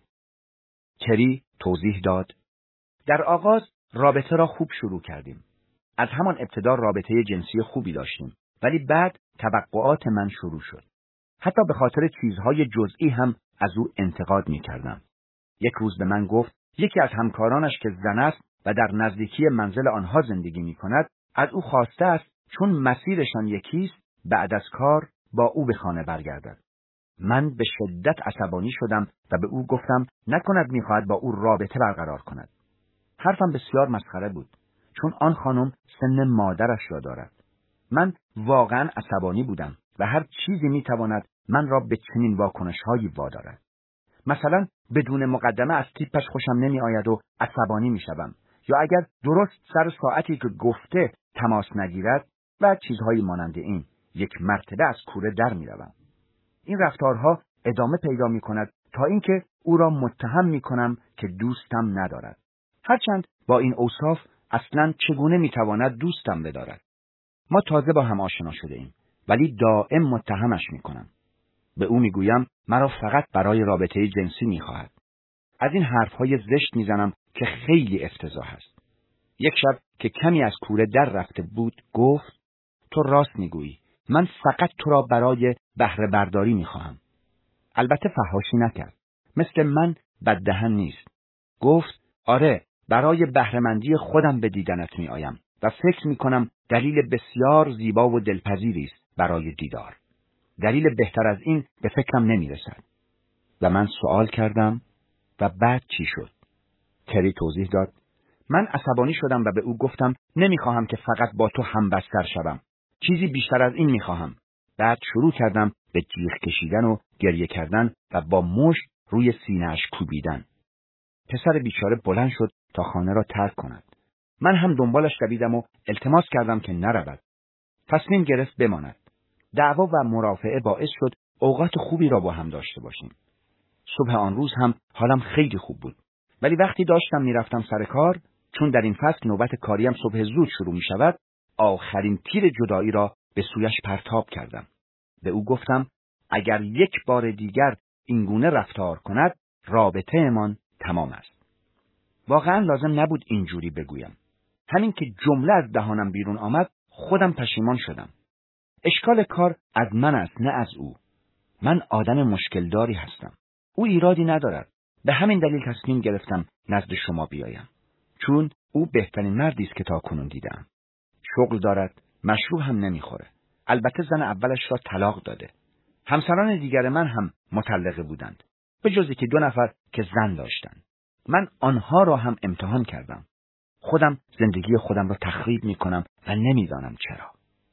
تری توضیح داد: در آغاز رابطه را خوب شروع کردیم. از همان ابتدا رابطه جنسی خوبی داشتیم، ولی بعد توقعات من شروع شد. حتی به خاطر چیزهای جزئی هم از او انتقاد می‌کردم. یک روز به من گفت یکی از همکارانش که زن است و در نزدیکی منزل آنها زندگی می‌کند، از او خواسته است چون مسیرشان یکیست بعد از کار با او به خانه برگردد. من به شدت عصبانی شدم و به او گفتم نکند می‌خواهد با او رابطه برقرار کند. حرفم بسیار مسخره بود، چون آن خانم سن مادرش را دارد. من واقعا عصبانی بودم و هر چیزی می‌تواند من را به چنین واکنش‌هایی وادارد. مثلا بدون مقدمه از تیپش خوشم نمی‌آید و عصبانی می‌شوم، یا اگر درست سر ساعتی که گفته تماس نگیرد و چیزهایی مانند این، یک مرتبه از کوره در می‌روم. این رفتارها ادامه پیدا می‌کند تا اینکه او را متهم می‌کنم که دوستم ندارد. هرچند با این اوصاف اصلاً چگونه می‌تواند دوستم بدارد؟ ما تازه با هم آشنا شده ایم، ولی دائم متهمش می‌کنم. به او می‌گویم مرا فقط برای رابطه جنسی می‌خواهد. از این حرف‌های زشت می‌زنم که خیلی افتضاح است. یک شب که کمی از کوره در رفته بود گفت تو راست می‌گویی. من فقط تو را برای بهره برداری می‌خواهم. البته فحاشی نکرد. مثل من بددهن نیست. گفت آره، برای بهره‌مندی خودم به دیدنت می‌آیم و فکر می‌کنم دلیل بسیار زیبا و دلپذیری است برای دیدار. دلیل بهتر از این به فکرم نمی‌رسد. و من سوال کردم و بعد چی شد؟ تری توضیح داد. من عصبانی شدم و به او گفتم نمی‌خواهم که فقط با تو همبستر شوم. چیزی بیشتر از این می‌خواهم. بعد شروع کردم به جیغ کشیدن و گریه کردن و با مشت روی سینه‌اش کوبیدن. پسر بیچاره بلند شد تا خانه را ترک کند. من هم دنبالش دویدم و التماس کردم که نرود. تصمیم گرفت بماند. دعوا و مرافعه باعث شد اوقات خوبی را با هم داشته باشیم. صبح آن روز هم حالم خیلی خوب بود. ولی وقتی داشتم میرفتم سر کار، چون در این فصل نوبت کاریم صبح زود شروع می شود، آخرین تیر جدایی را به سویش پرتاب کردم. به او گفتم اگر یک بار دیگر اینگونه رفتار کند، رابطه امان تمام است. واقعا لازم نبود اینجوری بگویم. همین که جمله از دهانم بیرون آمد، خودم پشیمان شدم. اشکال کار از من است، نه از او. من آدم مشکلداری هستم. او ایرادی ندارد. به همین دلیل تصمیم گرفتم نزد شما بیایم. چون او بهترین مردی است که تا کنون دیدم. شغل دارد، مشروب هم نمیخوره. البته زن اولش را طلاق داده. همسران دیگر من هم مطلقه بودند، به جزی که دو نفر که زن داشتند. من آنها را هم امتحان کردم. خودم زندگی خودم را تخریب میکنم و نمیدانم چرا.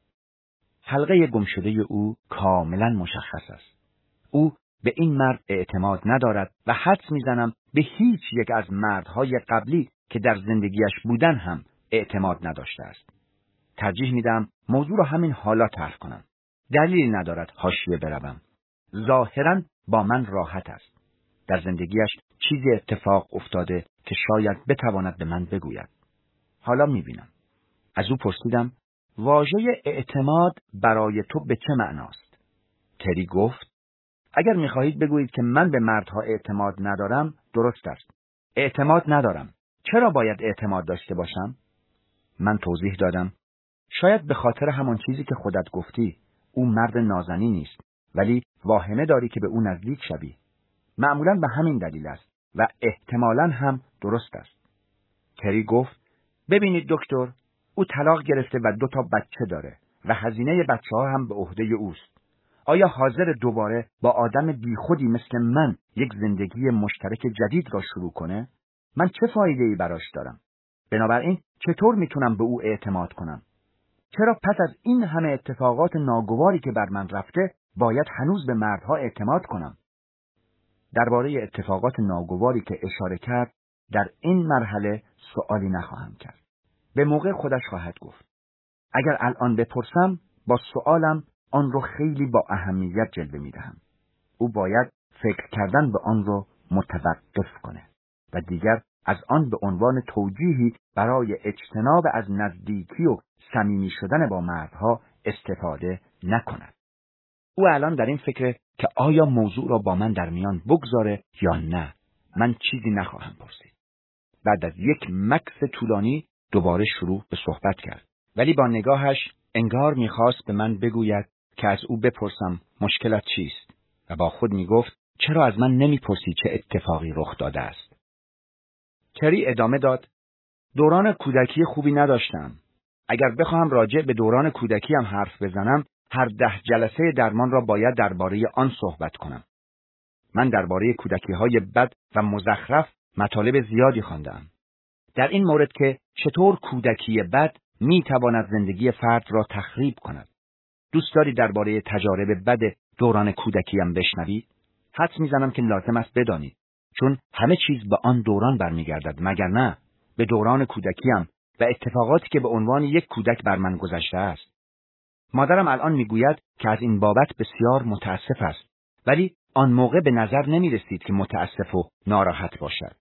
حلقه گمشده او کاملا مشخص است. او به این مرد اعتماد ندارد و حدس میزنم به هیچ یک از مردهای قبلی که در زندگیش بودن هم اعتماد نداشته است. ترجیح میدم موضوع را همین حالا طرح کنم. دلیلی ندارد حاشیه بروم. ظاهراً با من راحت است. در زندگیش چیزی اتفاق افتاده که شاید بتواند به من بگوید. حالا میبینم. از او پرسیدم واژه اعتماد برای تو به چه معناست؟ تری گفت اگر میخواهید بگویید که من به مردها اعتماد ندارم، درست است. اعتماد ندارم. چرا باید اعتماد داشته باشم؟ من توضیح دادم شاید به خاطر همان چیزی که خودت گفتی، او مرد نازنی نیست، ولی واهمه داری که به او نزدیک شوی. معمولاً به همین دلیل است و احتمالاً هم درست است. تری گفت ببینید دکتر، او طلاق گرفته و دو تا بچه داره و هزینه بچه ها هم به عهده اوست. آیا حاضر دوباره با آدم بیخودی مثل من یک زندگی مشترک جدید را شروع کنه؟ من چه فایده‌ای براش دارم؟ بنابراین چطور میتونم به او اعتماد کنم؟ چرا پس از این همه اتفاقات ناگواری که بر من رفته باید هنوز به مردها اعتماد کنم؟ درباره اتفاقات ناگواری که اشاره کرد در این مرحله سوالی نخواهم کرد. به موقع خودش خواهد گفت. اگر الان بپرسم با سوالم آن رو خیلی با اهمیت جلوه میدهم. او باید فکر کردن به آن رو متوقف کنه و دیگر از آن به عنوان توجیهی برای اجتناب از نزدیکی و صمیمی شدن با مردها استفاده نکند. او الان در این فکره که آیا موضوع را با من در میان بگذاره یا نه. من چیزی نخواهم پرسید. بعد از یک مکث طولانی دوباره شروع به صحبت کرد، ولی با نگاهش انگار میخواست به من بگوید که از او بپرسم مشکلت چیست و با خود میگفت چرا از من نمیپرسی چه اتفاقی رخ داده است. تری ادامه داد دوران کودکی خوبی نداشتم. اگر بخواهم راجع به دوران کودکی هم حرف بزنم، هر ده جلسه درمان را باید درباره آن صحبت کنم. من درباره کودکی‌های بد و مزخرف مطالب زیادی خواندم. در این مورد که چطور کودکی بد میتواند زندگی فرد را تخریب کند. دوست داری درباره تجارب بد دوران کودکیم بشنوید؟ حدس میزنم که لازم است بدانید، چون همه چیز به آن دوران برمیگردد، مگر نه؟ به دوران کودکیم و اتفاقاتی که به عنوان یک کودک بر من گذشته است. مادرم الان میگوید که از این بابت بسیار متاسف است، ولی آن موقع به نظر نمی رسید که متاسف و ناراحت باشد.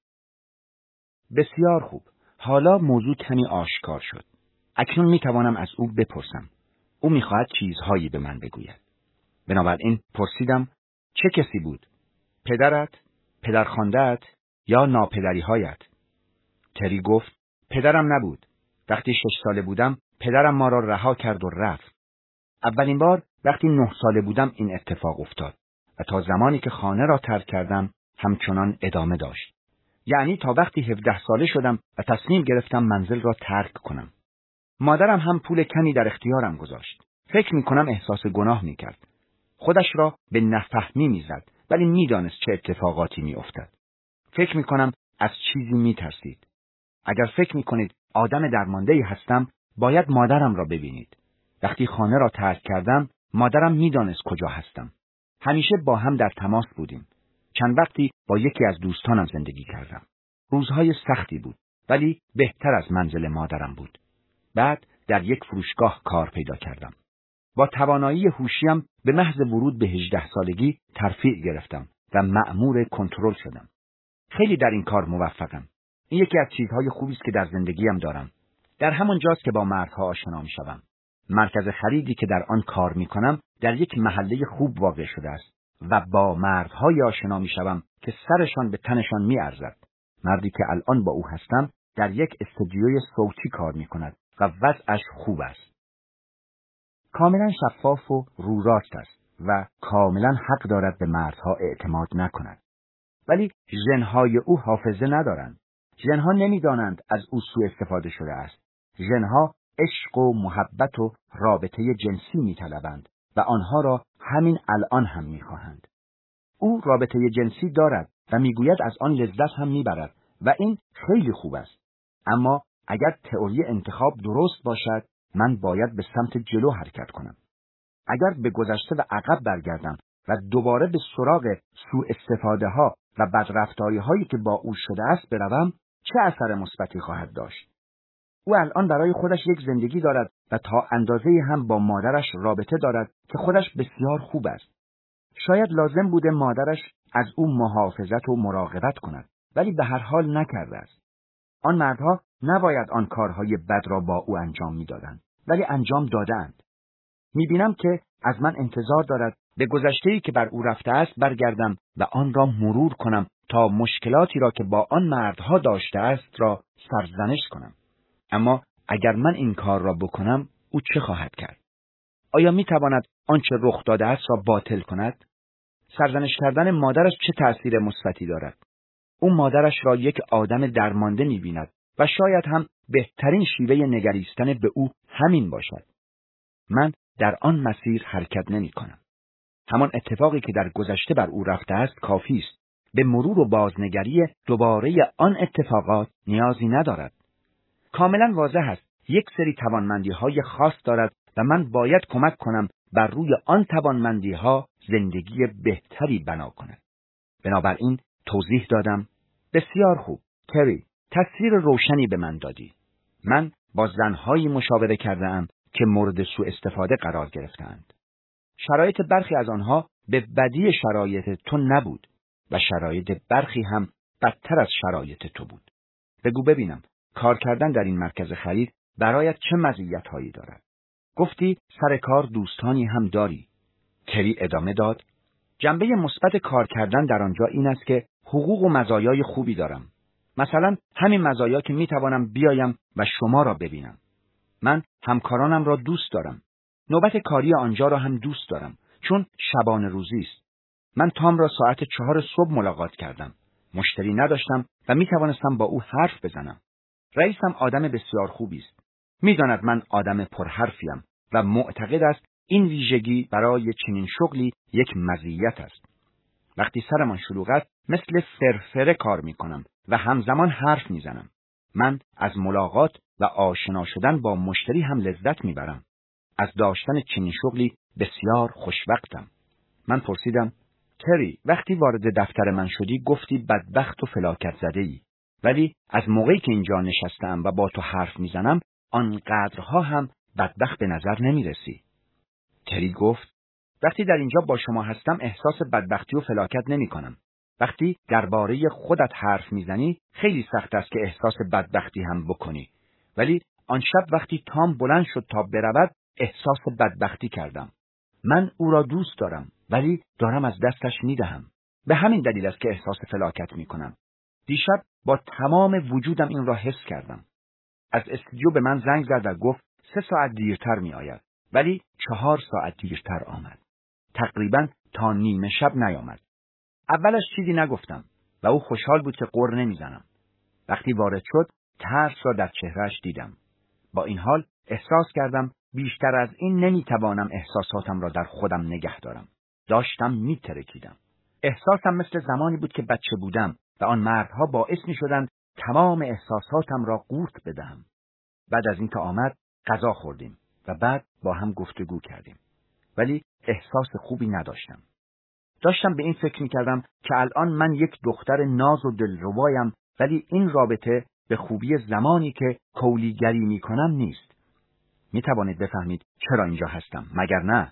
بسیار خوب. حالا موضوع کمی آشکار شد. اکنون می توانم از او بپرسم. او می خواهد چیزهایی به من بگوید. بنابراین پرسیدم چه کسی بود؟ پدرت؟ پدرخوانده‌ات؟ یا ناپدری‌هایت؟ تری گفت پدرم نبود. وقتی شش ساله بودم پدرم ما را رها کرد و رفت. اولین بار وقتی نه ساله بودم این اتفاق افتاد و تا زمانی که خانه را ترک کردم همچنان ادامه داشت. یعنی تا وقتی هفده ساله شدم و تصمیم گرفتم منزل را ترک کنم. مادرم هم پول کمی در اختیارم گذاشت. فکر می کنم احساس گناه می کرد. خودش را به نفهمی می زد، ولی می دانست چه اتفاقاتی می افتد. فکر می کنم از چیزی می ترسید. اگر فکر می کنید آدم درمانده‌ای هستم، باید مادرم را ببینید. وقتی خانه را ترک کردم، مادرم می دانست کجا هستم. همیشه با هم در تماس بودیم. چند وقتی با یکی از دوستانم زندگی کردم. روزهای سختی بود، ولی بهتر از منزل مادرم بود. بعد در یک فروشگاه کار پیدا کردم. با توانایی هوشیم به محض ورود به هجده سالگی ترفیع گرفتم و مأمور کنترل شدم. خیلی در این کار موفقم. این یکی از چیزهای خوبی است که در زندگیم دارم. در همان جاست که با مردها آشنا می‌شوم. مرکز خریدی که در آن کار می‌کنم در یک محله خوب واقع شده است و با مردهای آشنا می‌شوم که سرشان به تنشان می‌ارزد. مردی که الان با او هستم در یک استودیوی صوتی کار می‌کند و وضعش خوب است. کاملا شفاف و رو راست است و کاملا حق دارد به مردها اعتماد نکند. ولی ژن‌های او حافظه ندارند. ژن‌ها نمی‌دانند از او سوء استفاده شده است. ژن‌ها عشق و محبت و رابطه جنسی می‌طلبند و آنها را همین الان هم می‌خواهند. او رابطه جنسی دارد و می‌گوید از آن لذت هم می‌برد و این خیلی خوب است. اما اگر تئوری انتخاب درست باشد، من باید به سمت جلو حرکت کنم. اگر به گذشته و عقب برگردم و دوباره به سراغ سوء استفاده ها و بدرفتاری هایی که با او شده است بروم، چه اثر مثبتی خواهد داشت؟ او الان برای خودش یک زندگی دارد و تا اندازه هم با مادرش رابطه دارد که خودش بسیار خوب است. شاید لازم بوده مادرش از او محافظت و مراقبت کند، ولی به هر حال نکرده است. آن مردها نباید آن کارهای بد را با او انجام میدادند، ولی انجام دادند. میبینم که از من انتظار دارد به گذشته‌ای که بر او رفته است برگردم و آن را مرور کنم تا مشکلاتی را که با آن مردها داشته است را سرزنش کنم. اما اگر من این کار را بکنم، او چه خواهد کرد؟ آیا میتواند آنچه رخ داده است را باطل کند؟ سرزنش کردن مادرش چه تأثیر مثبتی دارد؟ او مادرش را یک آدم درمانده می‌بیند و شاید هم بهترین شیوه نگریستن به او همین باشد. من در آن مسیر حرکت نمی‌کنم. همان اتفاقی که در گذشته بر او رفته است کافی است. به مرور و بازنگری دوباره آن اتفاقات نیازی ندارد. کاملا واضح است یک سری توانمندی‌های خاص دارد و من باید کمک کنم بر روی آن توانمندی‌ها زندگی بهتری بنا کند. بنابراین توضیح دادم. بسیار خوب، تری، تصویر روشنی به من دادی. من با زنهایی مشاوره کرده‌ام که مورد سوء استفاده قرار گرفتند. شرایط برخی از آنها به بدی شرایط تو نبود و شرایط برخی هم بدتر از شرایط تو بود. بگو ببینم، کار کردن در این مرکز خرید برایت چه مزیت‌هایی دارد؟ گفتی سر کار دوستانی هم داری. تری ادامه داد. جنبه مثبت کار کردن در آنجا این است که حقوق و مزایای خوبی دارم. مثلا همین مزایا که میتوانم بیایم و شما را ببینم. من همکارانم را دوست دارم. نوبت کاری آنجا را هم دوست دارم، چون شبانه روزی است. من تام را ساعت چهار صبح ملاقات کردم. مشتری نداشتم و میتوانستم با او حرف بزنم. رئیسم آدم بسیار خوبی است. میداند من آدم پرحرفیم و معتقد است این ویژگی برای چنین شغلی یک مزیت است. وقتی سرمان شلوغ است مثل فرفره کار میکنم و همزمان حرف میزنم. من از ملاقات و آشنا شدن با مشتری هم لذت میبرم. از داشتن چنین شغلی بسیار خوشوقتم. من پرسیدم، تری، وقتی وارد دفتر من شدی گفتی بدبخت و فلاکت زده ای. ولی از موقعی که اینجا نشستم و با تو حرف میزنم آنقدرها هم بدبخت به نظر نمیرسی. تری گفت، وقتی در اینجا با شما هستم احساس بدبختی و فلاکت نمی کنم. وقتی درباره خودت حرف میزنی خیلی سخت است که احساس بدبختی هم بکنی. ولی آن شب وقتی تام بلند شد تا برود احساس بدبختی کردم. من او را دوست دارم ولی دارم از دستش میدهم. به همین دلیل است که احساس فلاکت میکنم. دیشب با تمام وجودم این را حس کردم. از استودیو به من زنگ زد و گفت سه ساعت دیرتر می آید. ولی چهار ساعت دیرتر آمد. تقریباً تا نیمه شب نیامد. اولش چیزی نگفتم و او خوشحال بود که غر نمیزنم. وقتی وارد شد ترس را در چهرهش دیدم. با این حال احساس کردم بیشتر از این نمیتوانم احساساتم را در خودم نگه دارم. داشتم میترکیدم. احساسم مثل زمانی بود که بچه بودم و آن مردها باعث میشدند تمام احساساتم را قورت بدهم. بعد از اینکه آمد غذا خوردیم و بعد با هم گفتگو کردیم. ولی احساس خوبی نداشتم. داشتم به این فکر میکردم که الان من یک دختر ناز و دلربایم، ولی این رابطه به خوبی زمانی که کولیگری میکنم نیست. می توانید بفهمید چرا اینجا هستم، مگر نه؟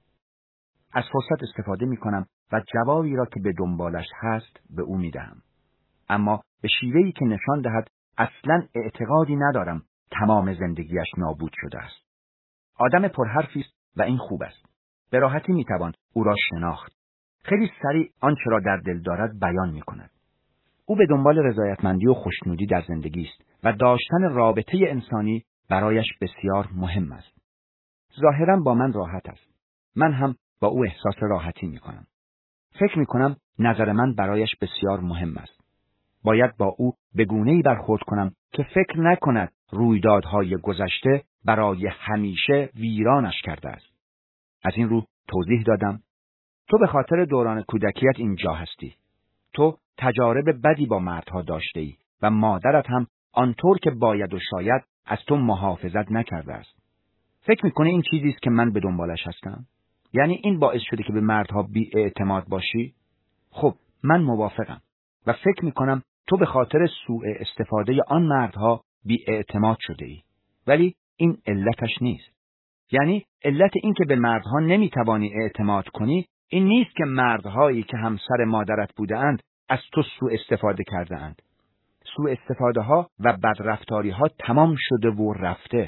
از فرصت استفاده می کنم و جوابی را که به دنبالش هست به او می دهم. اما به شیوهی که نشان دهد اصلاً اعتقادی ندارم تمام زندگیش نابود شده است. آدم پرحرفی است و این خوب است. به راحتی می توان او را شناخت. خیلی سریع آنچه را در دل دارد بیان می کند. او به دنبال رضایتمندی و خوشنودی در زندگی است و داشتن رابطه انسانی برایش بسیار مهم است. ظاهراً با من راحت است. من هم با او احساس راحتی می کنم. فکر می کنم نظر من برایش بسیار مهم است. باید با او به گونه‌ای برخورد کنم که فکر نکند رویدادهای گذشته برای همیشه ویرانش کرده است. از این رو توضیح دادم: تو به خاطر دوران کودکیت اینجا هستی. تو تجارب بدی با مردها داشته ای و مادرت هم آنطور که باید و شاید از تو محافظت نکرده است. فکر میکنی این چیزی است که من به دنبالش هستم؟ یعنی این باعث شده که به مردها بی اعتماد باشی؟ خب من موافقم و فکر میکنم تو به خاطر سوء استفاده آن مردها بی اعتماد شده ای. ولی این علتش نیست. یعنی علت این که به مردها نمیتوانی اعتماد کنی این نیست که مردهایی که همسر مادرت بودند از تو سوء استفاده کرده اند. سوء استفاده ها و بدرفتاری ها تمام شده و رفته.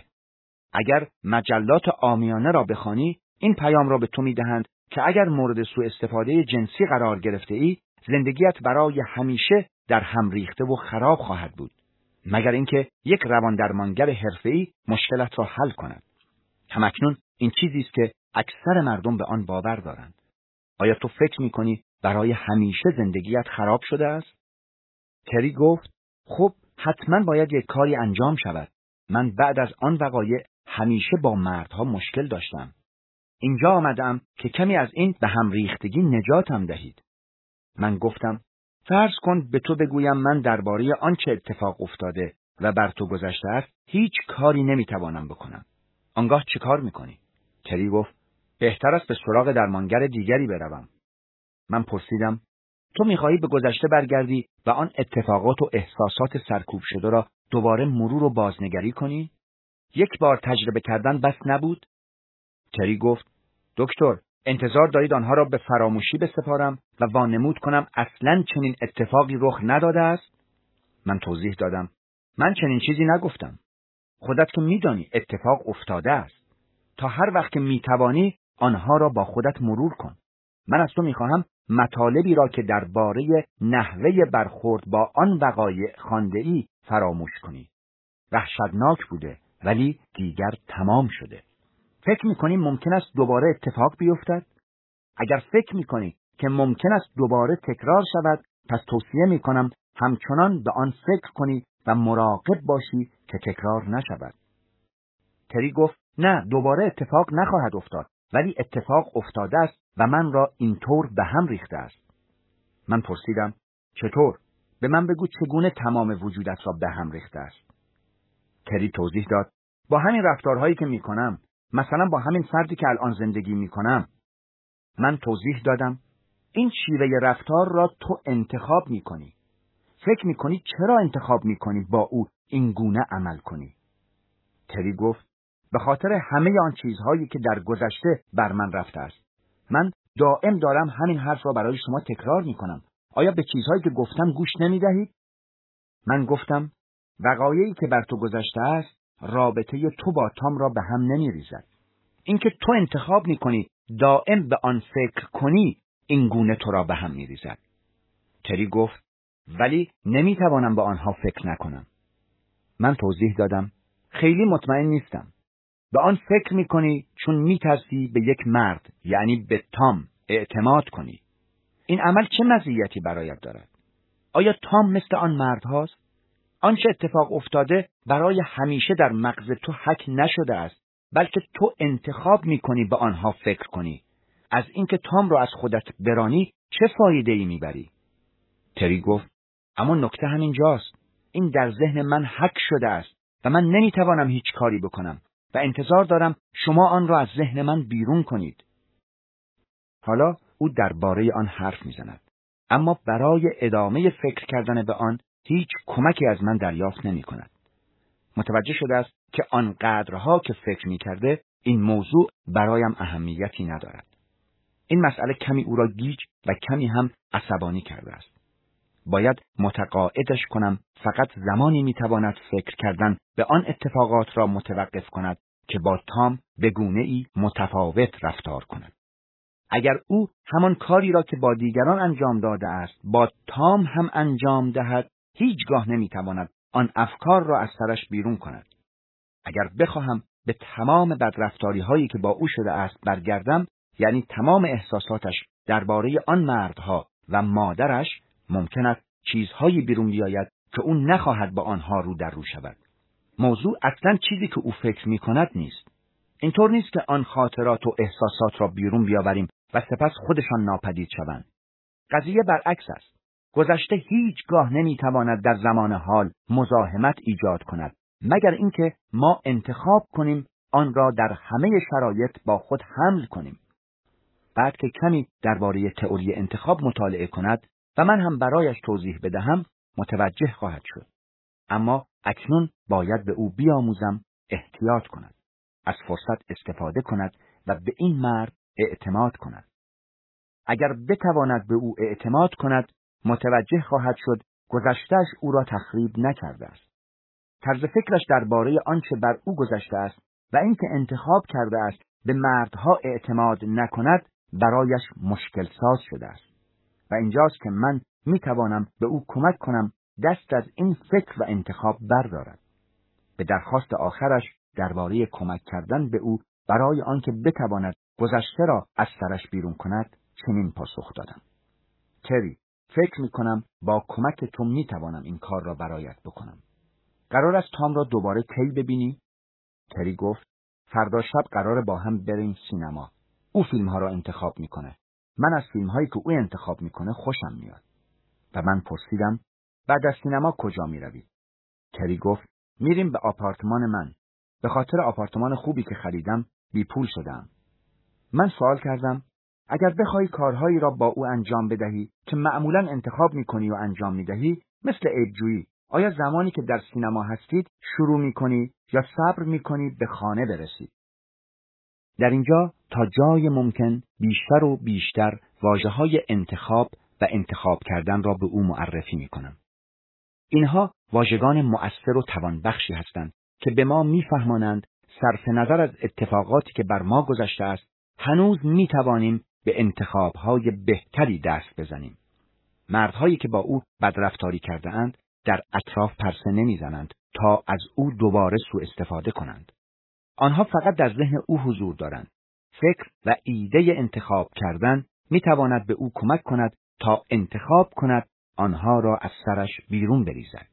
اگر مجلات عامیانه را بخوانی این پیام را به تو میدهند که اگر مورد سوء استفاده جنسی قرار گرفته ای زندگیت برای همیشه در هم ریخته و خراب خواهد بود، مگر اینکه یک رواندرمانگر حرفه‌ای مشکلت را حل کند. همکنون این چیزی است که اکثر مردم به آن باور دارند. آیا تو فکر می‌کنی برای همیشه زندگیت خراب شده است؟ تری گفت: خب حتما باید یک کاری انجام شود. من بعد از آن وقایع همیشه با مردها مشکل داشتم. اینجا آمدم که کمی از این به هم ریختگی نجاتم دهید. من گفتم: فرض کن به تو بگویم من درباره آنچه اتفاق افتاده و بر تو گذشته است هیچ کاری نمیتوانم بکنم. آنگاه چه کار میکنی؟ تری گفت: بهتر است به سراغ درمانگر دیگری بروم. من پرسیدم: تو میخواهی به گذشته برگردی و آن اتفاقات و احساسات سرکوب شده را دوباره مرور و بازنگری کنی؟ یک بار تجربه کردن بس نبود؟ تری گفت: دکتر، انتظار دارید آنها را به فراموشی بسپارم و وانمود کنم اصلاً چنین اتفاقی رخ نداده است؟ من توضیح دادم: من چنین چیزی نگفتم. خودت که میدانی اتفاق افتاده است. تا هر وقت که میتوانی آنها را با خودت مرور کن. من از تو میخواهم مطالبی را که درباره نحوه برخورد با آن وقایع خوانده‌ای فراموش کنی. وحشتناک بوده ولی دیگر تمام شده. فکر میکنی ممکن است دوباره اتفاق بیفتد؟ اگر فکر میکنی که ممکن است دوباره تکرار شود، پس توصیه میکنم همچنان به آن فکر کنی و مراقب باشی که تکرار نشود. تری گفت: نه، دوباره اتفاق نخواهد افتاد، ولی اتفاق افتاده است و من را اینطور به هم ریخته است. من پرسیدم: چطور؟ به من بگو چگونه تمام وجودت را به هم ریخته است. تری توضیح داد: با همین رفتارهایی که میکنم، مثلا با همین فردی که الان زندگی میکنم. من توضیح دادم: این شیوه رفتار را تو انتخاب میکنی. فکر میکنی چرا انتخاب میکنی با او این گونه عمل کنی؟ تری گفت: به خاطر همه آن چیزهایی که در گذشته بر من رفته است. من دائم دارم همین حرف را برای شما تکرار میکنم. آیا به چیزهایی که گفتم گوش نمیدهید؟ من گفتم: وقایعی که بر تو گذشته است رابطه تو با تام را به هم نمیریزد. اینکه تو انتخاب میکنی دائم به آن فکر کنی این گونه تو را به هم میریزد. تری گفت: ولی نمیتوانم به آنها فکر نکنم. من توضیح دادم: خیلی مطمئن نیستم. به آن فکر میکنی چون میترسی به یک مرد، یعنی به تام، اعتماد کنی. این عمل چه مزیتی برایت دارد؟ آیا تام مثل آن مرد هاست؟ آنچه اتفاق افتاده برای همیشه در مغز تو حک نشده است، بلکه تو انتخاب میکنی به آنها فکر کنی. از اینکه تام را از خودت برانی چه فایده‌ای میبری؟ تری گفت: اما نکته همین جاست. این در ذهن من حک شده است و من نمیتوانم هیچ کاری بکنم و انتظار دارم شما آن را از ذهن من بیرون کنید. حالا او درباره آن حرف میزند، اما برای ادامه فکر کردن به آن هیچ کمکی از من دریافت نمی کند. متوجه شده است که آنقدرها که فکر می‌کرده این موضوع برایم اهمیتی ندارد. این مسئله کمی او را گیج و کمی هم عصبانی کرده است. باید متقاعدش کنم فقط زمانی میتواند فکر کردن به آن اتفاقات را متوقف کند که با تام به گونه‌ای متفاوت رفتار کند. اگر او همان کاری را که با دیگران انجام داده است با تام هم انجام دهد، هیچگاه نمیتواند آن افکار را از سرش بیرون کند. اگر بخواهم به تمام بدرفتاری هایی که با او شده است برگردم، یعنی تمام احساساتش درباره آن مردها و مادرش، ممکن است چیزهایی بیرون بیاید که او نخواهد با آنها رو در رو شود. موضوع اصلا چیزی که او فکر می کند نیست. اینطور نیست که آن خاطرات و احساسات را بیرون بیاوریم و سپس خودشان ناپدید شوند. قضیه برعکس است. گذشته هیچگاه نمیتواند در زمان حال مزاحمت ایجاد کند، مگر اینکه ما انتخاب کنیم آن را در همه شرایط با خود حمل کنیم. بعد که کمی درباره تئوری انتخاب مطالعه کند و من هم برایش توضیح بدهم، متوجه خواهد شد. اما اکنون باید به او بیاموزم احتیاط کند، از فرصت استفاده کند و به این مرد اعتماد کند. اگر بتواند به او اعتماد کند، متوجه خواهد شد گذشته‌اش او را تخریب نکرده است. طرز فکرش درباره آنچه بر او گذشته است و اینکه انتخاب کرده است به مردها اعتماد نکند برایش مشکل ساز شده است. و اینجاست که من می توانم به او کمک کنم دست از این فکر و انتخاب بردارد. به درخواست آخرش درباره کمک کردن به او برای آنکه بتواند گذشته را از سرش بیرون کند چنین پاسخ دادم: تری، فکر می کنم با کمک تو می توانم این کار را برایت بکنم. قرار است تام را دوباره کی ببینی؟ تری گفت: فردا شب قراره با هم بریم سینما. او فیلم ها را انتخاب میکنه. من از فیلم هایی که او انتخاب میکنه خوشم میاد. و من پرسیدم: بعد از سینما کجا میروید؟ تری گفت: میریم به آپارتمان من. به خاطر آپارتمان خوبی که خریدم بی پول شدم. من سوال کردم: اگر بخوای کارهایی را با او انجام بدهی که معمولاً انتخاب میکنی و انجام میدهی، مثل عیب‌جویی، آیا زمانی که در سینما هستید شروع میکنی یا صبر میکنی به خانه برسید؟ در اینجا تا جای ممکن بیشتر و بیشتر واژه‌های انتخاب و انتخاب کردن را به او معرفی میکنم. اینها واژگان مؤثر و توانبخشی هستند که به ما میفهمانند صرف نظر از اتفاقاتی که بر ما گذشته است، هنوز میتوانیم به انتخاب‌های بهتری دست بزنیم. مردهایی که با او بدرفتاری کرده اند در اطراف پرسه نمیزنند تا از او دوباره سوء استفاده کنند. آنها فقط در ذهن او حضور دارند. فکر و ایده انتخاب کردن میتواند به او کمک کند تا انتخاب کند آنها را از سرش بیرون بریزد.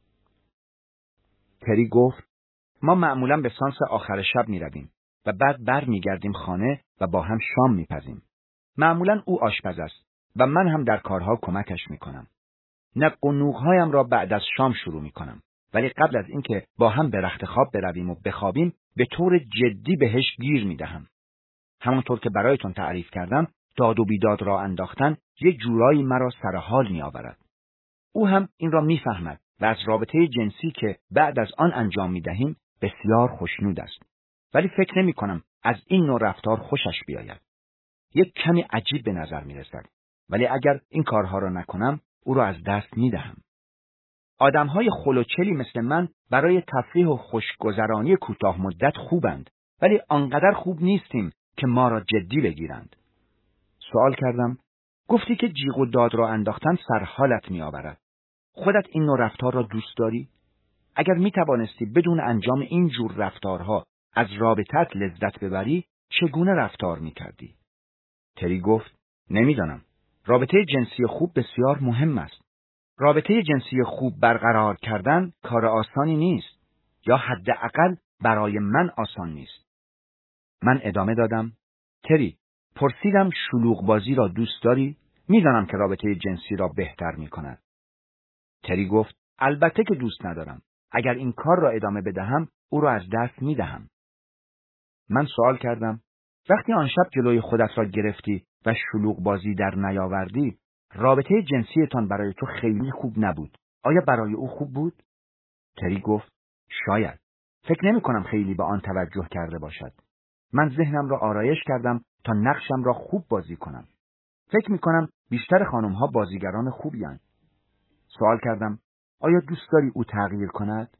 تری گفت: ما معمولاً به سانس آخر شب می رویم و بعد بر می گردیم خانه و با هم شام می پزیم. معمولاً او آشپز است و من هم در کارها کمکش می کنم. نق و نوغ‌هایم را بعد از شام شروع می کنم، ولی قبل از اینکه با هم به رخت خواب برویم و بخوابیم به طور جدی بهش گیر می دهم. همانطور که برایتون تعریف کردم، داد و بیداد را انداختن یک جورایی مرا سر حال می آورد. او هم این را می فهمد و از رابطه جنسی که بعد از آن انجام می دهیم بسیار خوشنود است. ولی فکر نمی کنم از این نوع رفتار خوشش بیاید. یک کمی عجیب به نظر می رسد. ولی اگر این کارها را نکنم او را از دست می دهم. آدمهای خلوچلی مثل من برای تفریح و خوشگذرانی کوتاه مدت خوبند، ولی آنقدر خوب نیستیم که ما را جدی بگیرند. سوال کردم: گفتی که جیغ و داد را انداختن سرحالت می آورد. خودت این نوع رفتار را دوست داری؟ اگر می توانستی بدون انجام این جور رفتارها از رابطت لذت ببری، چگونه رفتار می کردی؟ تری گفت: نمیدانم. رابطه جنسی خوب بسیار مهم است. رابطه جنسی خوب برقرار کردن کار آسانی نیست، یا حداقل برای من آسان نیست. من ادامه دادم: تری، پرسیدم شلوغ بازی را دوست داری؟ میدانم که رابطه جنسی را بهتر می کند. تری گفت: البته که دوست ندارم. اگر این کار را ادامه بدهم او را از دست می دهم. من سوال کردم: وقتی آن شب جلوی خودت را گرفتی و شلوغ بازی در نیاوردی، رابطه جنسیتان برای تو خیلی خوب نبود. آیا برای او خوب بود؟ تری گفت: شاید. فکر نمی کنم خیلی به آن توجه کرده باشد. من ذهنم را آرایش کردم تا نقشم را خوب بازی کنم. فکر می کنم بیشتر خانم ها بازیگران خوبی هستند. سوال کردم آیا دوست داری او تغییر کند؟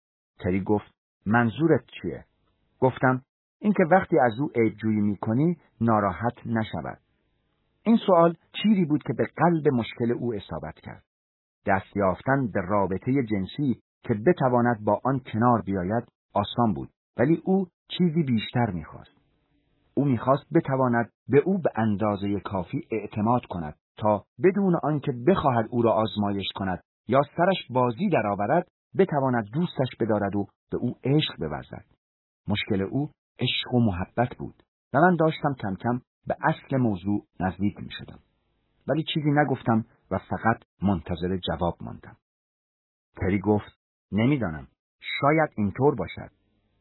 تری گفت منظورت چیه؟ گفتم اینکه وقتی از او عیب‌جویی می‌کنی ناراحت نشود. این سوال چیزی بود که به قلب مشکل او اصابت کرد. دست یافتن به رابطه جنسی که بتواند با آن کنار بیاید آسان بود، ولی او چیزی بیشتر می‌خواست. او می‌خواست بتواند به او به اندازه کافی اعتماد کند تا بدون آنکه بخواهد او را آزمایش کند یا سرش بازی درآورد بتواند دوستش بدارد و به او عشق بورزد. مشکل او عشق و محبت بود و من داشتم کم کم به اصل موضوع نزدیک می شدم. ولی چیزی نگفتم و فقط منتظر جواب ماندم. تری گفت نمیدانم، شاید اینطور باشد.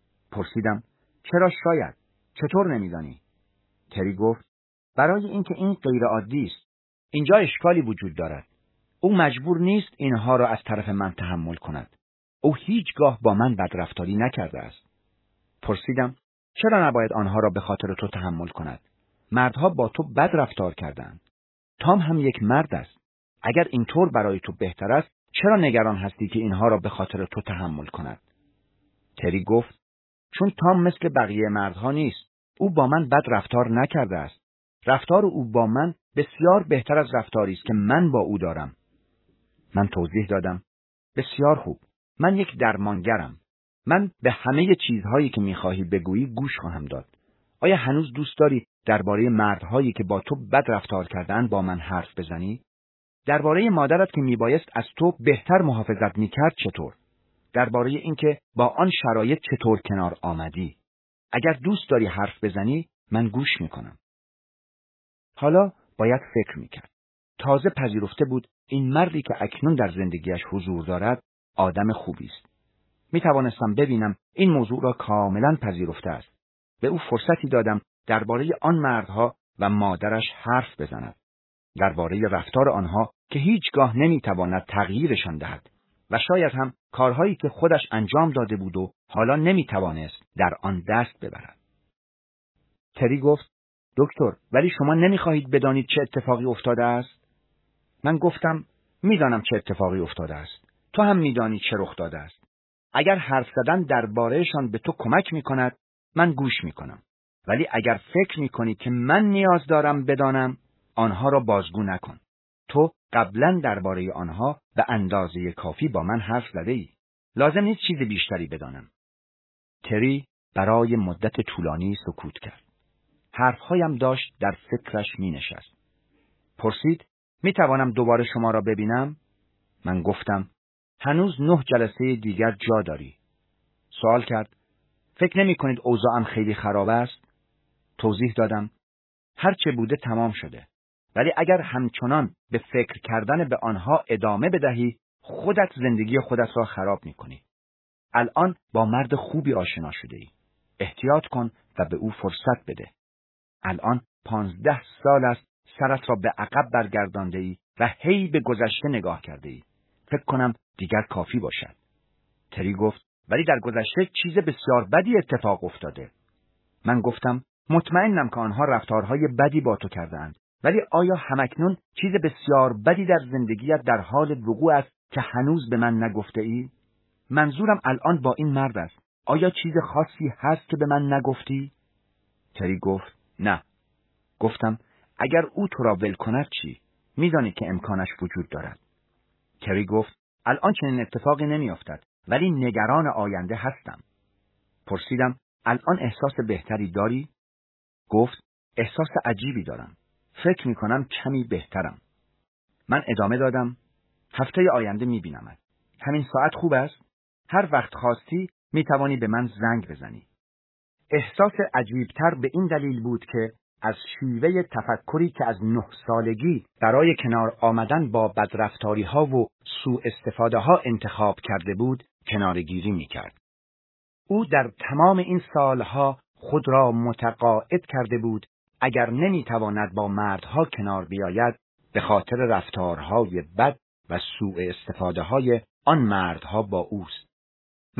پرسیدم چرا شاید؟ چطور نمیدانی؟ تری گفت برای اینکه این غیر عادی است. اینجا اشکالی وجود دارد. او مجبور نیست اینها را از طرف من تحمل کند. او هیچگاه با من بدرفتاری نکرده است. پرسیدم چرا نباید آنها را به خاطر تو تحمل کند؟ مردها با تو بد رفتار کردند. تام هم یک مرد است. اگر اینطور برای تو بهتر است، چرا نگران هستی که اینها را به خاطر تو تحمل کند؟ تری گفت چون تام مثل بقیه مردها نیست. او با من بد رفتار نکرده است. رفتار او با من بسیار بهتر از رفتاری است که من با او دارم. من توضیح دادم بسیار خوب. من یک درمانگرم. من به همه چیزهایی که می‌خواهی بگویی گوش خواهم داد. آیا هنوز دوست داری درباره مردهایی که با تو بد رفتار کردند با من حرف بزنی؟ درباره مادرت که میبایست از تو بهتر محافظت میکرد چطور؟ درباره اینکه با آن شرایط چطور کنار آمدی؟ اگر دوست داری حرف بزنی من گوش میکنم. حالا باید فکر میکرد. تازه پذیرفته بود این مردی که اکنون در زندگیش حضور دارد آدم خوبی است. میتوانستم ببینم این موضوع را کاملا پذیرفته است. به او فرصتی دادم درباره آن مردها و مادرش حرف بزند. درباره رفتار آنها که هیچگاه نمیتواند تغییرشان دهد و شاید هم کارهایی که خودش انجام داده بود و حالا نمیتوانست در آن دست ببرد. تری گفت دکتر ولی شما نمیخواهید بدانید چه اتفاقی افتاده است؟ من گفتم میدانم چه اتفاقی افتاده است. تو هم میدانی چه رخ داده است. اگر حرف زدن دربارهشان به تو کمک میکند من گوش میکنم. ولی اگر فکر میکنی که من نیاز دارم بدانم آنها را بازگو نکن. تو قبلا درباره آنها به اندازه کافی با من حرف زده ای. لازم نیست چیز بیشتری بدانم. تری برای مدت طولانی سکوت کرد. حرفهایم داشت در فکرش می نشست. پرسید می توانم دوباره شما را ببینم؟ من گفتم هنوز نه جلسه دیگر جا داری. سوال کرد فکر نمی کنید اوضاعم خیلی خراب است؟ توضیح دادم هرچه بوده تمام شده. ولی اگر همچنان به فکر کردن به آنها ادامه بدهی خودت زندگی خودت را خراب می کنی. الان با مرد خوبی آشنا شده ای. احتیاط کن و به او فرصت بده. الان پانزده سال است سرت را به عقب برگردانده ای و هی به گذشته نگاه کرده ای. فکر کنم دیگر کافی باشد. تری گفت ولی در گذشته چیز بسیار بدی اتفاق افتاده. من گفتم مطمئنم که آنها رفتارهای بدی با تو کردند. ولی آیا همکنون چیز بسیار بدی در زندگیت در حال وقوع است که هنوز به من نگفته ای؟ منظورم الان با این مرد است. آیا چیز خاصی هست که به من نگفتی؟ تری گفت نه. گفتم اگر او تو را ول کند چی؟ میدانی که امکانش وجود دارد. تری گفت الان چنین اتفاقی نمیافتد ولی نگران آینده هستم. پرسیدم الان احساس بهتری داری؟ گفت احساس عجیبی دارم. فکر می کنم کمی بهترم. من ادامه دادم هفته آینده می بینمت. همین ساعت خوب است؟ هر وقت خواستی می توانی به من زنگ بزنی. احساس عجیبتر به این دلیل بود که از شیوه تفکری که از نه سالگی برای کنار آمدن با بدرفتاری ها و سوء استفاده ها انتخاب کرده بود کنارگیری می کرد. او در تمام این سالها خود را متقاعد کرده بود اگر نمیتواند با مردها کنار بیاید به خاطر رفتارهای بد و سوء استفاده های آن مردها با اوست. من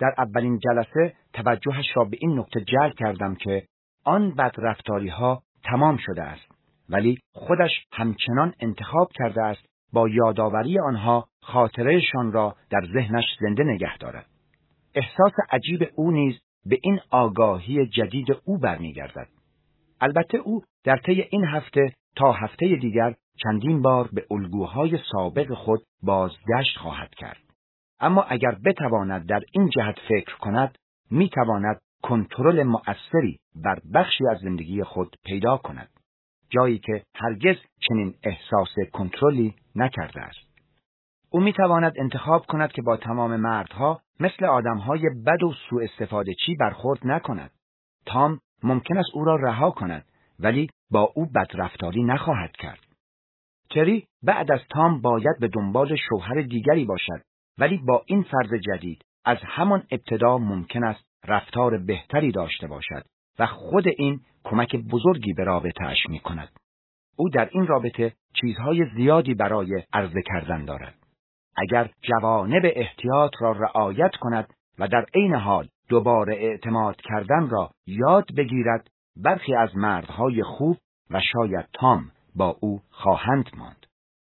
در اولین جلسه توجهش را به این نکته جلب کردم که آن بدرفتاری‌ها تمام شده است، ولی خودش همچنان انتخاب کرده است با یادآوری آنها خاطرهشان را در ذهنش زنده نگه دارد. احساس عجیب او نیز به این آگاهی جدید او برمیگردد. البته او در طی این هفته تا هفته دیگر چندین بار به الگوهای سابق خود بازگشت خواهد کرد. اما اگر بتواند در این جهت فکر کند، میتواند کنترل مؤثری بر بخشی از زندگی خود پیدا کند، جایی که هرگز چنین احساس کنترلی نکرده است. او میتواند انتخاب کند که با تمام مردها مثل آدمهای بد و سوء استفاده چی برخورد نکند. تام ممکن است او را رها کند، ولی با او بدرفتاری نخواهد کرد. تری بعد از تام باید به دنبال شوهر دیگری باشد، ولی با این فرد جدید از همان ابتدا ممکن است رفتار بهتری داشته باشد و خود این کمک بزرگی به رابطه‌اش می‌کند. او در این رابطه چیزهای زیادی برای عرضه کردن دارد. اگر جوانب احتیاط را رعایت کند و در عین حال دوباره اعتماد کردن را یاد بگیرد، برخی از مردهای خوب و شاید تام با او خواهند ماند.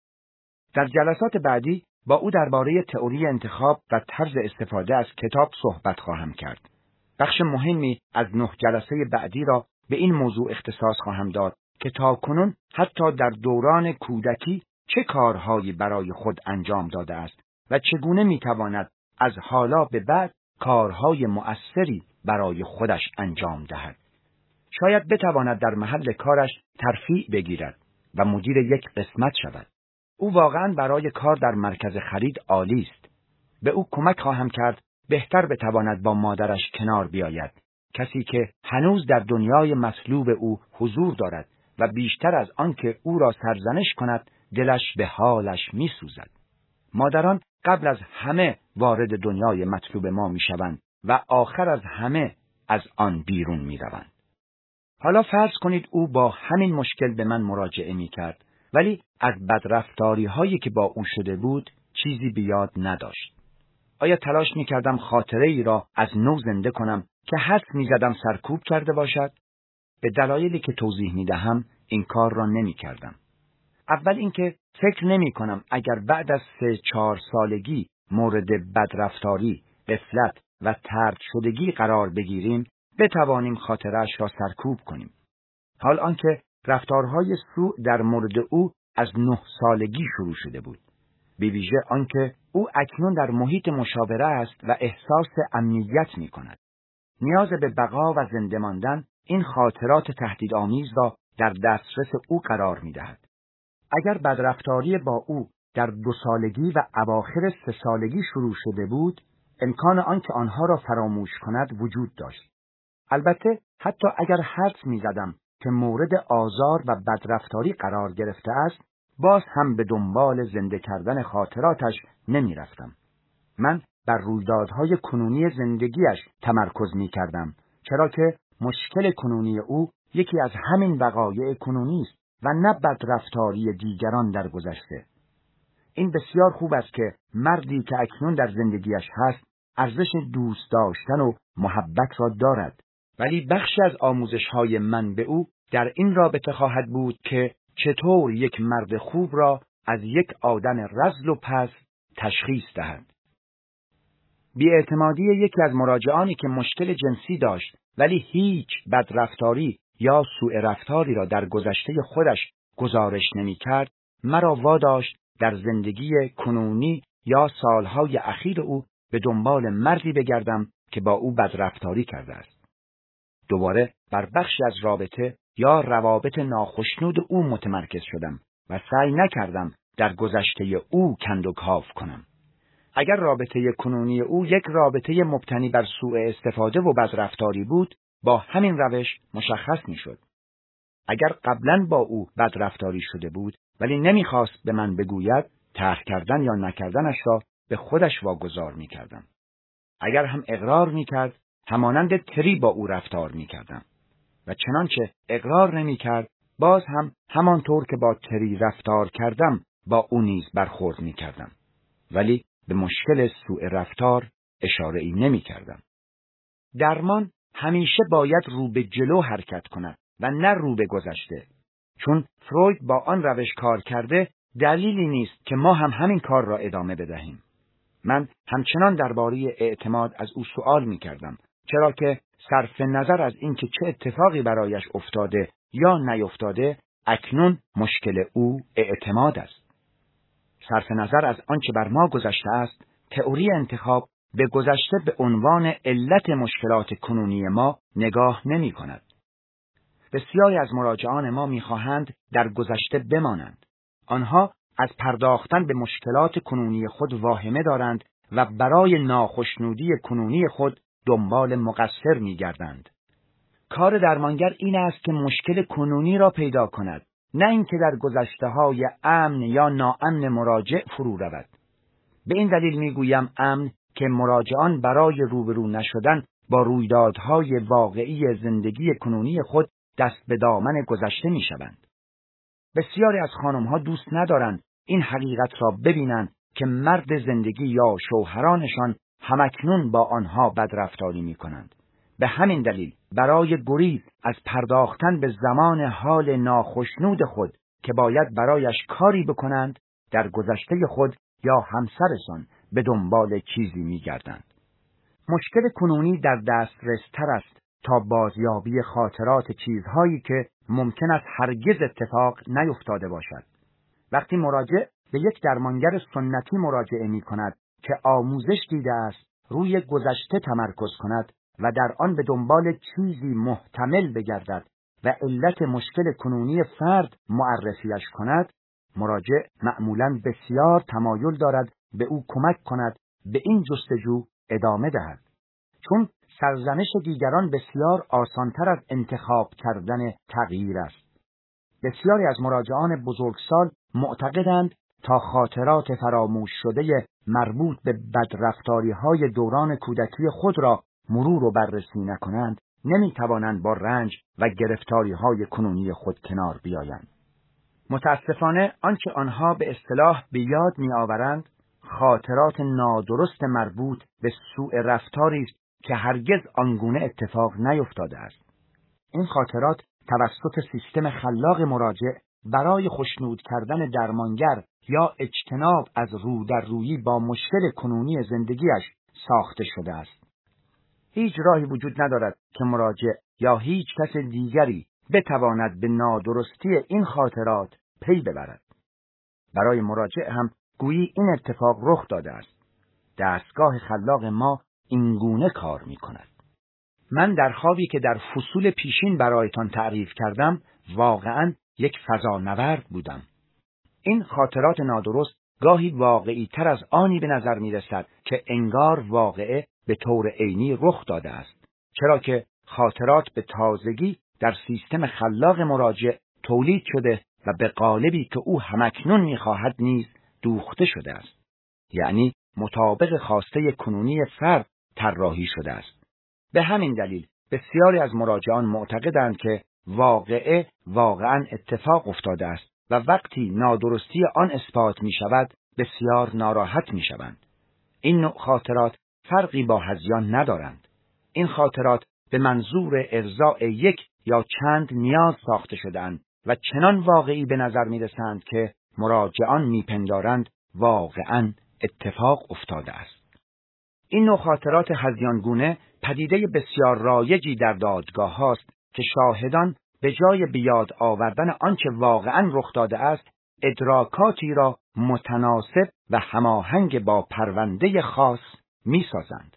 در جلسات بعدی با او درباره تئوری انتخاب و طرز استفاده از کتاب صحبت خواهم کرد. بخش مهمی از نه جلسه بعدی را به این موضوع اختصاص خواهم داد که تاکنون حتی در دوران کودکی چه کارهایی برای خود انجام داده است و چگونه میتواند از حالا به بعد کارهای مؤثری برای خودش انجام دهد. شاید بتواند در محل کارش ترفیع بگیرد و مدیر یک قسمت شود. او واقعا برای کار در مرکز خرید عالی است. به او کمک خواهم کرد بهتر بتواند با مادرش کنار بیاید، کسی که هنوز در دنیای مطلوب او حضور دارد و بیشتر از آن که او را سرزنش کند دلش به حالش می سوزد. مادران قبل از همه وارد دنیای مطلوب ما می شوند و آخر از همه از آن بیرون می روند. حالا فرض کنید او با همین مشکل به من مراجعه می کرد، ولی از بدرفتاری هایی که با او شده بود چیزی به یاد نداشت. آیا تلاش می کردم خاطره ای را از نو زنده کنم که حدس می زدم سرکوب کرده باشد؟ به دلایلی که توضیح می دهم این کار را نمی کردم. اول اینکه فکر نمی کنم اگر بعد از سه چهار سالگی مورد بدرفتاری، غفلت و طرد شدگی قرار بگیریم بتوانیم خاطره‌اش را سرکوب کنیم. حال آنکه رفتارهای سوء در مورد او از نه سالگی شروع شده بود. به ویژه آنکه او اکنون در محیط مشاوره است و احساس امنیت می کند. نیاز به بقا و زنده ماندن این خاطرات تهدیدآمیز را در دسترس او قرار می دهد. اگر بدرفتاری با او در دو سالگی و اواخر سه سالگی شروع شده بود، امکان آنکه آنها را فراموش کند وجود داشت. البته حتی اگر حدس می زدم که مورد آزار و بدرفتاری قرار گرفته است، باز هم به دنبال زنده کردن خاطراتش نمی رفتم. من بر رویدادهای کنونی زندگیش تمرکز می کردم، چرا که مشکل کنونی او یکی از همین وقایع کنونی است و نه بدرفتاری دیگران در گذشته. این بسیار خوب است که مردی که اکنون در زندگیش هست ارزش دوست داشتن و محبت را دارد، ولی بخشی از آموزش‌های من به او در این رابطه خواهد بود که چطور یک مرد خوب را از یک آدم رذل و پست تشخیص دهد. بی‌اعتمادی یکی از مراجعانی که مشکل جنسی داشت ولی هیچ بدرفتاری یا سوء رفتاری را در گذشته خودش گزارش نمی‌کرد، مرا واداشت در زندگی کنونی یا سالهای اخیر او به دنبال مردی بگردم که با او بدرفتاری کرده است. دوباره بر بخشی از رابطه یا روابط ناخشنود او متمرکز شدم و سعی نکردم در گذشته او کند و کاو کنم. اگر رابطه کنونی او یک رابطه مبتنی بر سوء استفاده و بدرفتاری بود، با همین روش مشخص میشد. اگر قبلا با او بدرفتاری شده بود ولی نمیخواست به من بگوید، طرح کردن یا نکردنش را به خودش واگذار میکردم. اگر هم اقرار میکرد، همانند تری با او رفتار میکردم و چنانچه اقرار نمیکرد، باز هم همانطور که با تری رفتار کردم با او نیز برخورد میکردم. ولی به مشکل سوء رفتار اشاره ای نمی کردم. درمان همیشه باید رو به جلو حرکت کند و نه رو به گذشته. چون فروید با آن روش کار کرده، دلیلی نیست که ما هم همین کار را ادامه بدهیم. من همچنان درباره اعتماد از او سوال می کردم، چرا که صرف نظر از اینکه چه اتفاقی برایش افتاده یا نیفتاده، اکنون مشکل او اعتماد است. صرف نظر از آنچه بر ما گذشته است، تئوری انتخاب به گذشته به عنوان علت مشکلات کنونی ما نگاه نمی کند. بسیاری از مراجعان ما می خواهند در گذشته بمانند. آنها از پرداختن به مشکلات کنونی خود واهمه دارند و برای ناخشنودی کنونی خود دنبال مقصر می گردند. کار درمانگر این است که مشکل کنونی را پیدا کند، نه اینکه در گذشته‌های امن یا ناامن مراجع فرو رود. به این دلیل می گویم امن که مراجعان برای روبرو نشدن با رویدادهای واقعی زندگی کنونی خود دست به دامن گذشته می شوند. بسیاری از خانم‌ها دوست ندارند این حقیقت را ببینند که مرد زندگی یا شوهرانشان همکنون با آنها بدرفتاری می کنند. به همین دلیل برای گریز از پرداختن به زمان حال ناخشنود خود که باید برایش کاری بکنند، در گذشته خود یا همسرشان به دنبال چیزی می گردند. مشکل کنونی در دسترس تر است تا بازیابی خاطرات چیزهایی که ممکن است هرگز اتفاق نیفتاده باشد. وقتی مراجع به یک درمانگر سنتی مراجعه می کند که آموزش دیده است روی گذشته تمرکز کند و در آن به دنبال چیزی محتمل بگردد و علت مشکل کنونی فرد معرفیش کند، مراجع معمولاً بسیار تمایل دارد به او کمک کند به این جستجو ادامه دهد. چون سرزنش دیگران بسیار آسانتر از انتخاب کردن تغییر است. بسیاری از مراجعان بزرگسال معتقدند تا خاطرات فراموش شده مربوط به بدرفتاری‌های دوران کودکی خود را مرور و بررسی نکنند، نمی‌توانند با رنج و گرفتاری‌های کنونی خود کنار بیایند. متاسفانه آنچه آنها به اصطلاح به یاد می‌آورند خاطرات نادرست مربوط به سوء رفتاری است که هرگز آنگونه اتفاق نیفتاده است. این خاطرات توسط سیستم خلاق مراجع برای خوشنود کردن درمانگر یا اجتناب از رو در رویی با مشکل کنونی زندگیش ساخته شده است. هیچ راهی وجود ندارد که مراجع یا هیچ کس دیگری بتواند به نادرستی این خاطرات پی ببرد. برای مراجع هم گویی این اتفاق رخ داده است. دستگاه خلاق ما اینگونه کار می کند. من در خوابی که در فصول پیشین برایتان تعریف کردم واقعاً یک فضانورد بودم. این خاطرات نادرست گاهی واقعی تر از آنی به نظر می رسد که انگار واقعه به طور عینی رخ داده است، چرا که خاطرات به تازگی در سیستم خلاق مراجع تولید شده و به قالبی که او همکنون می خواهد نیز دوخته شده است. یعنی مطابق خواسته کنونی فرد طراحی شده است. به همین دلیل بسیاری از مراجعان معتقدند که واقعه واقعاً اتفاق افتاده است و وقتی نادرستی آن اثبات می شود بسیار ناراحت می شوند. این نوع خاطرات فرقی با هذیان ندارند. این خاطرات به منظور ارضاء یک یا چند نیاز ساخته شده‌اند و چنان واقعی به نظر می رسند که مراجعان می پندارند واقعاً اتفاق افتاده است. این نوع خاطرات هذیانگونه پدیده بسیار رایجی در دادگاه هاست که شاهدان به جای بیاد آوردن آنچه واقعاً رخ داده است، ادراکاتی را متناسب و هماهنگ با پرونده خاص می سازند.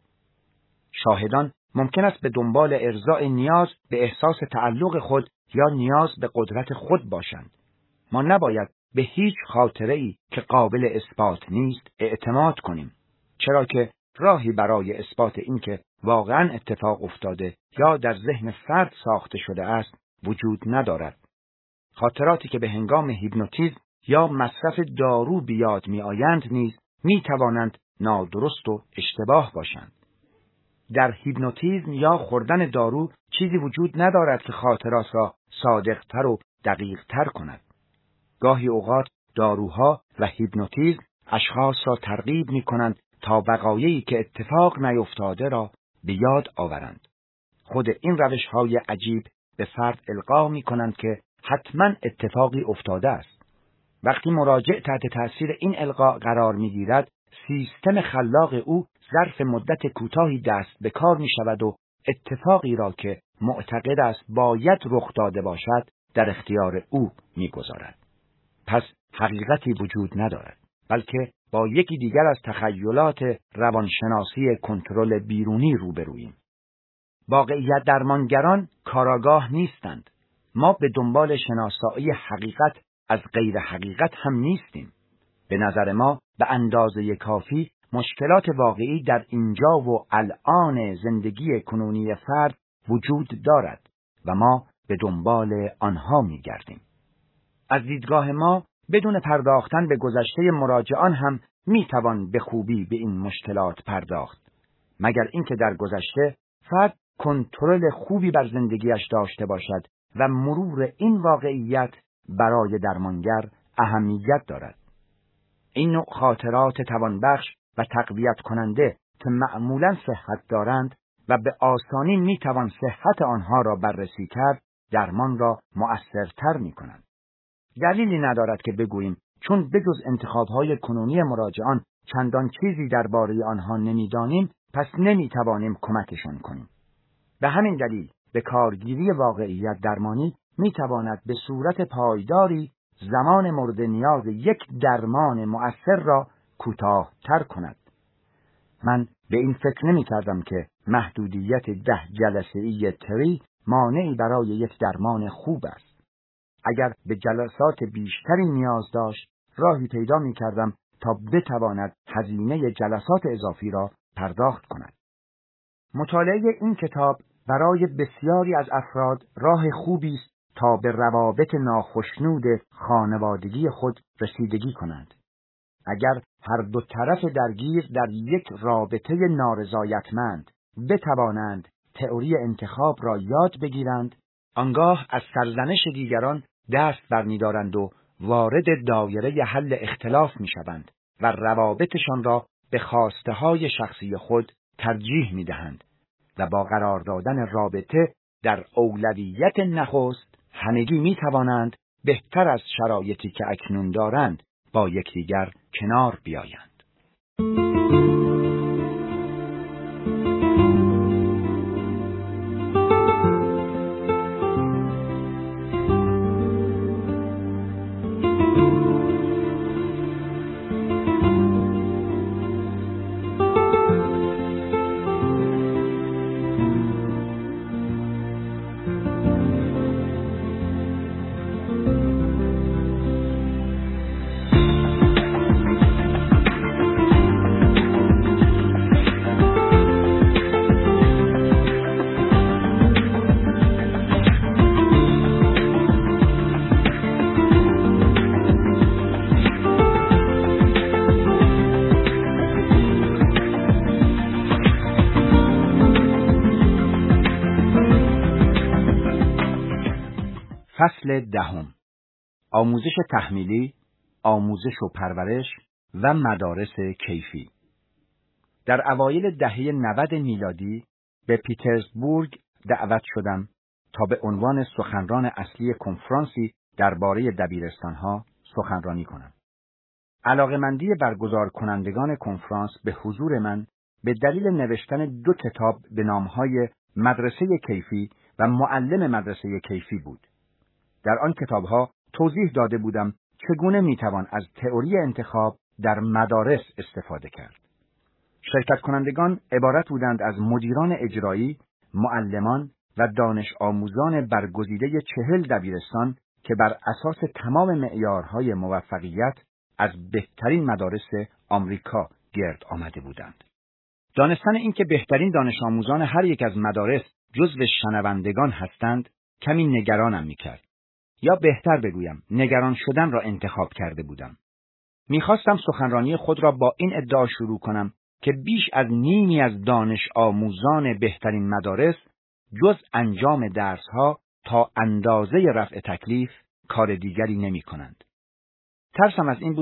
شاهدان ممکن است به دنبال ارضاء نیاز به احساس تعلق خود یا نیاز به قدرت خود باشند. ما نباید به هیچ خاطره‌ای که قابل اثبات نیست اعتماد کنیم، چرا که راهی برای اثبات اینکه واقعاً اتفاق افتاده یا در ذهن فرد ساخته شده است وجود ندارد. خاطراتی که به هنگام هیپنوتیزم یا مصرف دارو بیاد می آیند نیز می توانند نادرست و اشتباه باشند. در هیپنوتیزم یا خوردن دارو چیزی وجود ندارد که خاطرات را صادق‌تر و دقیق‌تر کند. گاهی اوقات داروها و هیپنوتیزم اشخاص را ترغیب می کنند تا وقایعی که اتفاق نیفتاده را به یاد آورند. خود این روش‌های عجیب به فرد القا می‌کنند که حتماً اتفاقی افتاده است. وقتی مراجع تحت تأثیر این القا قرار می‌گیرد، سیستم خلاق او ظرف مدت کوتاهی دست به کار می‌شود و اتفاقی را که معتقد است باید رخ داده باشد در اختیار او می‌گذارد. پس حقیقتی وجود ندارد، بلکه با یکی دیگر از تخیلات روانشناسی کنترل بیرونی روبروییم. واقعیت درمانگران کاراگاه نیستند. ما به دنبال شناسایی حقیقت از غیر حقیقت هم نیستیم. به نظر ما به اندازه کافی مشکلات واقعی در اینجا و الان زندگی کنونی فرد وجود دارد و ما به دنبال آنها می گردیم. از دیدگاه ما بدون پرداختن به گذشته مراجعان هم می توان به خوبی به این مشکلات پرداخت، مگر اینکه در گذشته فرد کنترل خوبی بر زندگیش داشته باشد و مرور این واقعیت برای درمانگر اهمیت دارد. این نوع خاطرات توانبخش و تقویت کننده که معمولاً صحت دارند و به آسانی می توان صحت آنها را بررسی کرد، درمان را مؤثرتر می کنند. دلیلی ندارد که بگوییم چون بجز انتخاب‌های کنونی مراجعان چندان چیزی درباره آنها نمی‌دانیم، پس نمی‌توانیم کمکشان کنیم. به همین دلیل به کارگیری واقعیت درمانی می‌تواند به صورت پایداری زمان مورد نیاز یک درمان مؤثر را کوتاه‌تر کند. من به این فکر نمی‌کردم که محدودیت ده جلسه‌ای تری مانعی برای یک درمان خوب است. اگر به جلسات بیشتری نیاز داشت، راهی پیدا می‌کردم تا بتواند هزینه جلسات اضافی را پرداخت کند. مطالعه این کتاب برای بسیاری از افراد راه خوبی است تا به روابط ناخشنود خانوادگی خود رسیدگی کنند. اگر هر دو طرف درگیر در یک رابطه نارضایتمند بتوانند تئوری انتخاب را یاد بگیرند، آنگاه از سرزنش دیگران دست برمی‌دارند و وارد دایره حل اختلاف می‌شوند و روابطشان را به خواسته‌های شخصی خود ترجیح می‌دهند و با قرار دادن رابطه در اولویت نخست همگی می‌توانند بهتر از شرایطی که اکنون دارند با یکدیگر کنار بیایند. فصل دهم: آموزش تحمیلی، آموزش و پرورش و مدارس کیفی. در اوایل دهه نود میلادی به پیترزبورگ دعوت شدم تا به عنوان سخنران اصلی کنفرانسی درباره دبیرستان‌ها سخنرانی کنم. علاقه‌مندی برگزار کنندگان کنفرانس به حضور من به دلیل نوشتن دو کتاب به نام‌های مدرسه کیفی و معلم مدرسه کیفی بود. در آن کتاب‌ها توضیح داده بودم چگونه میتوان از تئوری انتخاب در مدارس استفاده کرد. شرکت کنندگان عبارت بودند از مدیران اجرایی، معلمان و دانش آموزان برگزیده چهل دبیرستان که بر اساس تمام معیارهای موفقیت از بهترین مدارس آمریکا گرد آمده بودند. دانستن اینکه بهترین دانش آموزان هر یک از مدارس جزو شنوندگان هستند کمی نگرانم میکرد. یا بهتر بگویم نگران شدن را انتخاب کرده بودم. میخواستم سخنرانی خود را با این ادعا شروع کنم که بیش از نیمی از دانش آموزان بهترین مدارس جز انجام درسها تا اندازه رفع تکلیف کار دیگری نمی کنند. ترسم از این بود که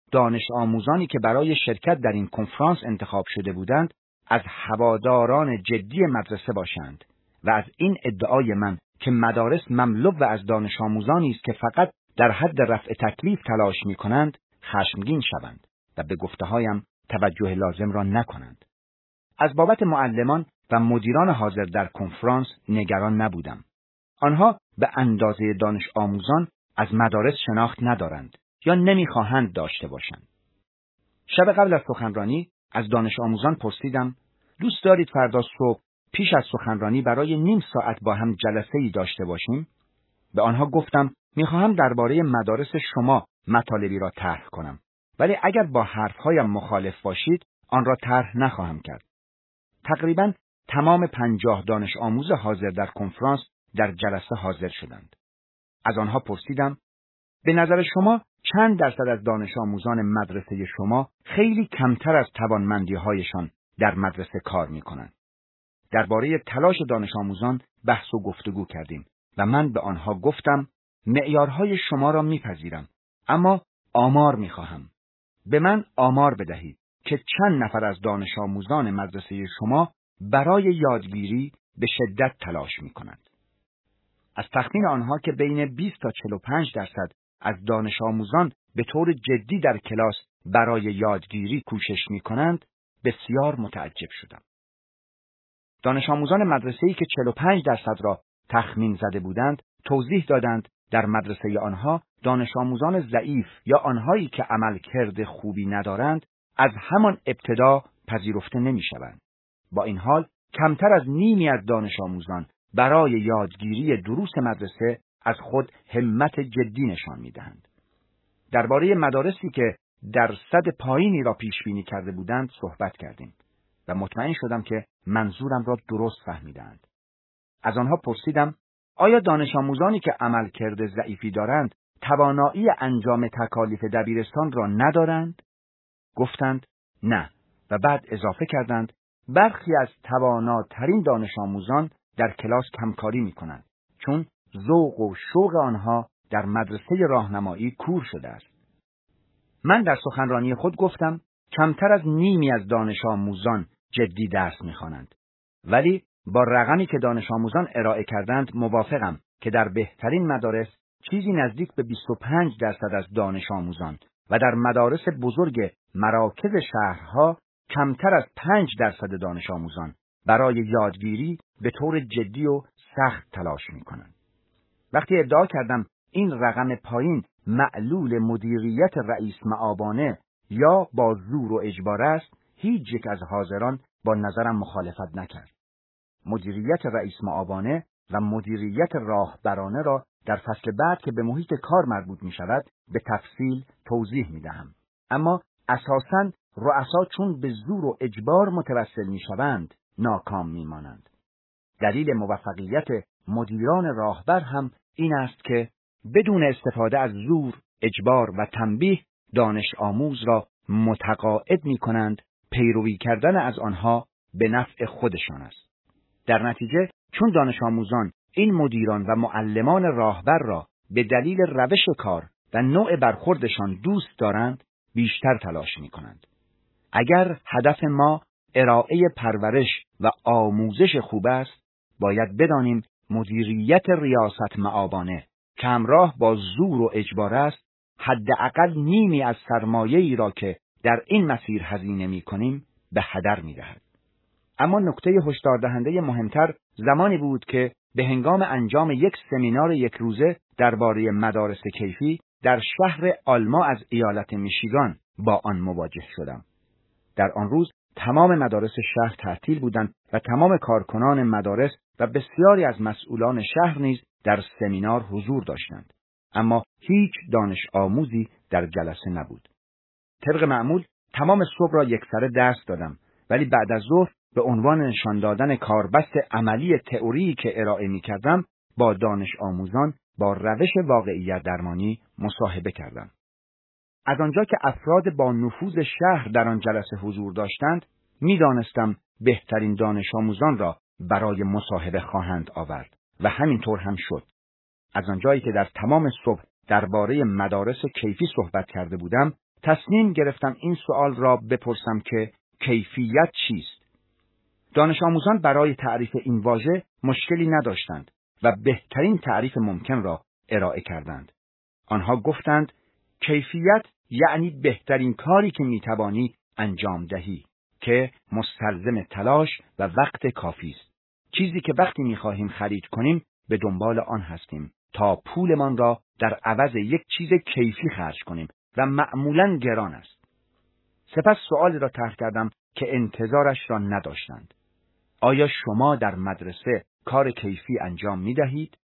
دانش آموزانی که برای شرکت در این کنفرانس انتخاب شده بودند از هواداران جدی مدرسه باشند و از این ادعای من که مدارس مملو از دانش آموزانی است که فقط در حد رفع تکلیف تلاش می‌کنند خشمگین شوند و به گفته‌هایم توجه لازم را نکنند. از بابت معلمان و مدیران حاضر در کنفرانس نگران نبودم. آنها به اندازه دانش آموزان از مدارس شناخت ندارند یا نمی‌خواهند داشته باشند. شب قبل از سخنرانی از دانش آموزان پرسیدم دوست دارید فردا صبح پیش از سخنرانی برای نیم ساعت با هم جلسه‌ای داشته باشیم؟ به آنها گفتم می‌خواهم درباره مدارس شما مطالبی را طرح کنم، ولی اگر با حرف‌هایم مخالف باشید آن را طرح نخواهم کرد. تقریباً تمام پنجاه دانش آموز حاضر در کنفرانس در جلسه حاضر شدند. از آنها پرسیدم به نظر شما چند درصد از دانش آموزان مدرسه شما خیلی کمتر از توانمندی‌هایشان در مدرسه کار می‌کنند؟ درباره تلاش دانش آموزان بحث و گفتگو کردیم و من به آنها گفتم معیارهای شما را میپذیرم، اما آمار میخواهم. به من آمار بدهید که چند نفر از دانش آموزان مدرسه شما برای یادگیری به شدت تلاش میکنند. از تخمین آنها که بین بیست تا چهل و پنج درصد از دانش آموزان به طور جدی در کلاس برای یادگیری کوشش میکنند بسیار متعجب شدم. دانش آموزان مدرسه‌ای که چهل و پنج درصد را تخمین زده بودند توضیح دادند در مدرسه آنها دانش آموزان ضعیف یا آنهایی که عملکرد خوبی ندارند از همان ابتدا پذیرفته نمی‌شوند. با این حال کمتر از نیمی از دانش آموزان برای یادگیری دروس مدرسه از خود همت جدی نشان می‌دهند. درباره مدارسی که درصد پایینی را پیش بینی کرده بودند صحبت کردیم و مطمئن شدم که منظورم را درست فهمیدند. از آنها پرسیدم آیا دانش آموزانی که عملکرد ضعیفی دارند توانایی انجام تکالیف دبیرستان را ندارند؟ گفتند نه و بعد اضافه کردند برخی از تواناترین دانش آموزان در کلاس کمکاری می کنند چون ذوق و شوق آنها در مدرسه راهنمایی کور شده است. من در سخنرانی خود گفتم کمتر از نیمی از دانش آموزان جدی درس می‌خوانند، ولی با رقمی که دانش آموزان ارائه کردند موافقم که در بهترین مدارس چیزی نزدیک به بیست و پنج درصد از دانش آموزان و در مدارس بزرگ مراکز شهرها کمتر از پنج درصد دانش آموزان برای یادگیری به طور جدی و سخت تلاش می‌کنند. وقتی ادعا کردم این رقم پایین معلول مدیریت رئیس معابانه یا با زور و اجبار است، هیچ یک از حاضران با نظرم مخالفت نکرد. مدیریت رئیس معابانه و مدیریت راهبرانه را در فصل بعد که به محیط کار مربوط می شود به تفصیل توضیح می دهم. اما اساساً رؤسا چون به زور و اجبار متوسل می شوند ناکام می مانند. دلیل موفقیت مدیران راهبر هم این است که بدون استفاده از زور، اجبار و تنبیه دانش آموز را متقاعد می کنند پیروی کردن از آنها به نفع خودشان است. در نتیجه چون دانش آموزان این مدیران و معلمان راهبر را به دلیل روش کار و نوع برخوردشان دوست دارند بیشتر تلاش می کنند. اگر هدف ما ارائه پرورش و آموزش خوب است باید بدانیم مدیریت ریاست معابانه که همراه با زور و اجبار است حداقل نیمی از سرمایه‌ای را که در این مسیر هزینه می‌کنیم به هدر می‌دهد. اما نکته هشدار دهنده مهمتر زمانی بود که به هنگام انجام یک سمینار یک روزه درباره مدارس کیفی در شهر آلما از ایالت میشیگان با آن مواجه شدم. در آن روز تمام مدارس شهر تعطیل بودند و تمام کارکنان مدارس و بسیاری از مسئولان شهر نیز در سمینار حضور داشتند، اما هیچ دانش آموزی در جلسه نبود. طبق معمول تمام صبح را یکسره درس دادم، ولی بعد از ظهر به عنوان نشان دادن کاربست عملی تئوری که ارائه می کردم با دانش آموزان با روش واقعیت درمانی مصاحبه کردم. از آنجا که افراد با نفوذ شهر در آن جلسه حضور داشتند، می دانستم بهترین دانش آموزان را برای مصاحبه خواهند آورد و همینطور هم شد. از آنجایی که در تمام صبح درباره مدارس کیفی صحبت کرده بودم، تصمیم گرفتم این سوال را بپرسم که کیفیت چیست؟ دانش آموزان برای تعریف این واژه مشکلی نداشتند و بهترین تعریف ممکن را ارائه کردند. آنها گفتند کیفیت یعنی بهترین کاری که میتوانی انجام دهی که مستلزم تلاش و وقت کافی است. چیزی که وقتی میخواهیم خرید کنیم به دنبال آن هستیم تا پولمان را در عوض یک چیز کیفی خرج کنیم و معمولاً گران است. سپس سؤالی را طرح کردم که انتظارش را نداشتند. آیا شما در مدرسه کار کیفی انجام می دهید؟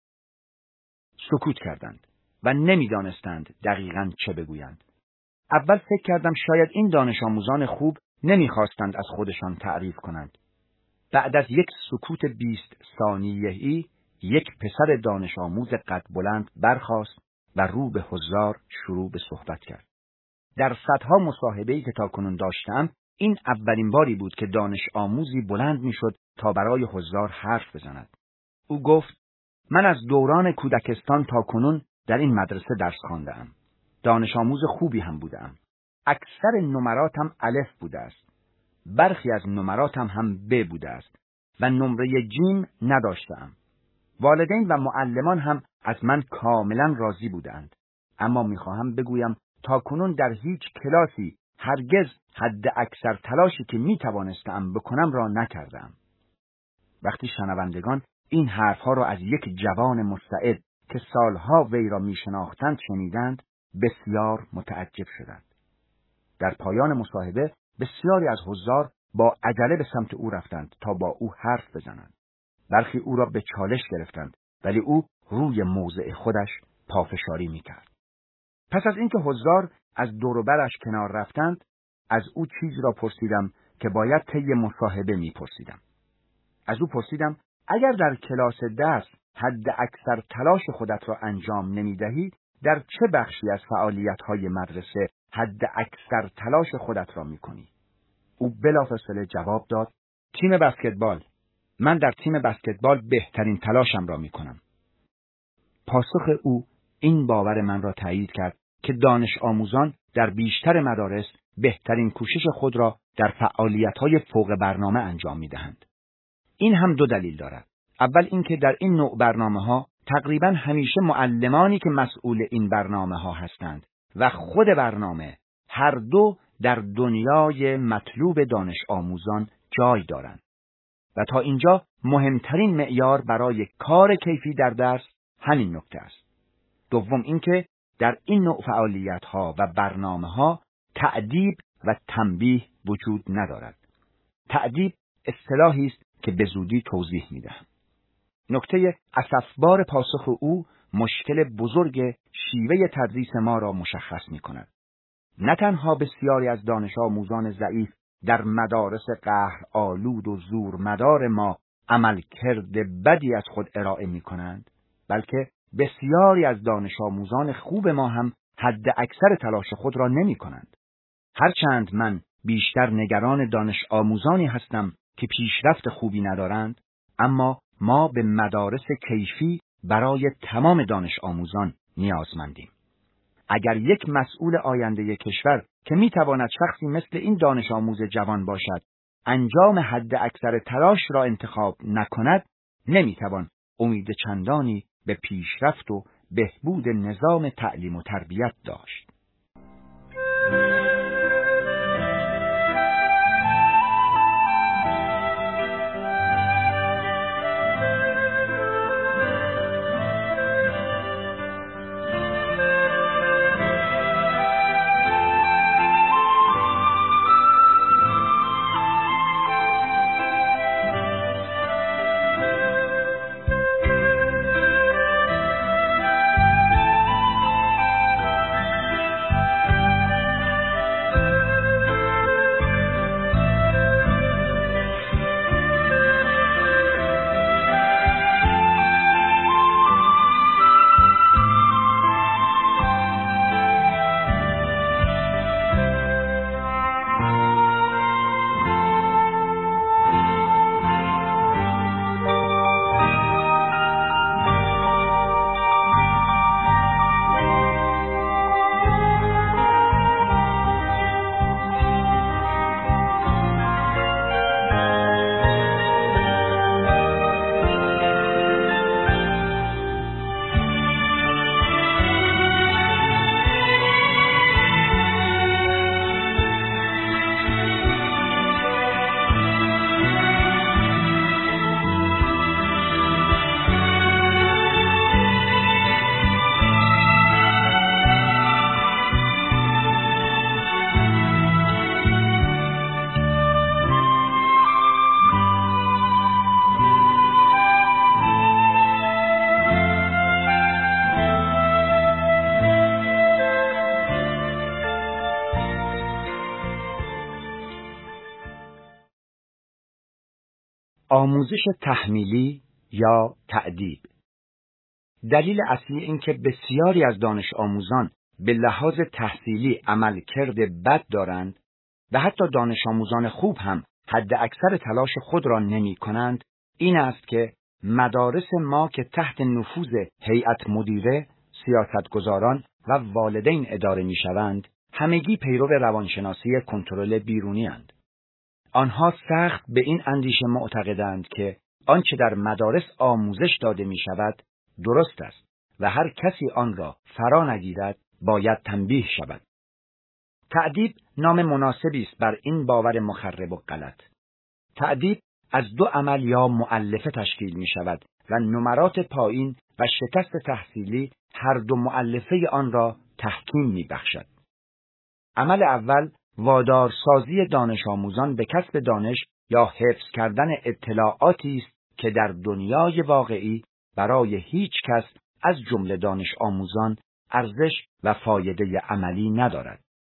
سکوت کردند و نمی دانستند دقیقاً چه بگویند. اول فکر کردم شاید این دانش آموزان خوب نمی خواستند از خودشان تعریف کنند. بعد از یک سکوت بیست ثانیه‌ای یک پسر دانش آموز قد بلند برخاست و رو به حضار شروع به صحبت کرد. در صدها مصاحبه‌ای که تاکنون داشتم، این اولین باری بود که دانش آموزی بلند میشد تا برای حضار حرف بزند. او گفت: من از دوران کودکستان تاکنون در این مدرسه درس خوانده‌ام. دانش آموز خوبی هم بودم. اکثر نمراتم الف بوده است. برخی از نمراتم هم ب بوده است و نمره جیم نداشتم. والدین و معلمان هم از من کاملا راضی بودند. اما میخواهم بگویم تاکنون در هیچ کلاسی هرگز حد اکثر تلاشی که میتوانستم بکنم را نکردم. وقتی شنوندگان این حرفها را از یک جوان مستعد که سالها وی را میشناختند شنیدند، بسیار متعجب شدند. در پایان مصاحبه بسیاری از حضار با عجله به سمت او رفتند تا با او حرف بزنند. برخی او را به چالش گرفتند، ولی او روی موضع خودش پافشاری میکرد. پس از اینکه حضار از دور و برش کنار رفتند، از او چیزی را پرسیدم که باید طی مصاحبه میپرسیدم. از او پرسیدم اگر در کلاس درس حد اکثر تلاش خودت را انجام نمیدهی، در چه بخشی از فعالیت‌های مدرسه حد اکثر تلاش خودت را میکنی؟ او بلافاصله جواب داد: تیم بسکتبال. من در تیم بسکتبال بهترین تلاشم را میکنم. پاسخ او این باور من را تایید کرد که دانش آموزان در بیشتر مدارس بهترین کوشش خود را در فعالیت‌های فوق برنامه انجام می‌دهند. این هم دو دلیل دارد. اول اینکه در این نوع برنامه‌ها تقریباً همیشه معلمانی که مسئول این برنامه‌ها هستند و خود برنامه، هر دو در دنیای مطلوب دانش آموزان جای دارند. و تا اینجا مهمترین معیار برای کار کیفی در درس همین نکته است. دوم اینکه در این نوع فعالیت‌ها و برنامه‌ها تأدیب و تنبیه وجود ندارد. تأدیب اصطلاحی است که به زودی توضیح می‌دهم. نکته اسفبار پاسخ او مشکل بزرگ شیوه تدریس ما را مشخص می‌کند. نه تنها بسیاری از دانش آموزان ضعیف در مدارس قهر آلود و زور مدار ما عملکرد بدی از خود ارائه می‌کنند، بلکه بسیاری از دانش آموزان خوب ما هم حد اکثر تلاش خود را نمی کنند. هرچند من بیشتر نگران دانش آموزانی هستم که پیشرفت خوبی ندارند، اما ما به مدارس کیفی برای تمام دانش آموزان نیازمندیم. اگر یک مسئول آینده کشور که می تواند شخصی مثل این دانش آموز جوان باشد، انجام حد اکثر تلاش را انتخاب نکند، نمی توان امید چندانی به پیشرفت و بهبود نظام تعلیم و تربیت داشت. آموزش تحمیلی یا تأدیب. دلیل اصلی این که بسیاری از دانش آموزان به لحاظ تحصیلی عملکرد بد دارند و حتی دانش آموزان خوب هم حد اکثر تلاش خود را نمی کنند، این است که مدارس ما که تحت نفوذ هیئت مدیره، سیاستگزاران و والدین اداره می شوند، همگی پیرو روانشناسی کنترل بیرونی اند. آنها سخت به این اندیشه معتقدند که آنچه در مدارس آموزش داده می شود درست است و هر کسی آن را فرا نگیرد باید تنبیه شود. تأدیب نام مناسبی است بر این باور مخرب و غلط. تأدیب از دو عمل یا مؤلفه تشکیل می شود و نمرات پایین و شکست تحصیلی هر دو مؤلفه آن را تحکیم می بخشد. عمل اول وادارسازی دانش آموزان به کسب دانش یا حفظ کردن اطلاعاتی است که در دنیای واقعی برای هیچ کس از جمله دانش آموزان ارزش و فایده عملی ندارد.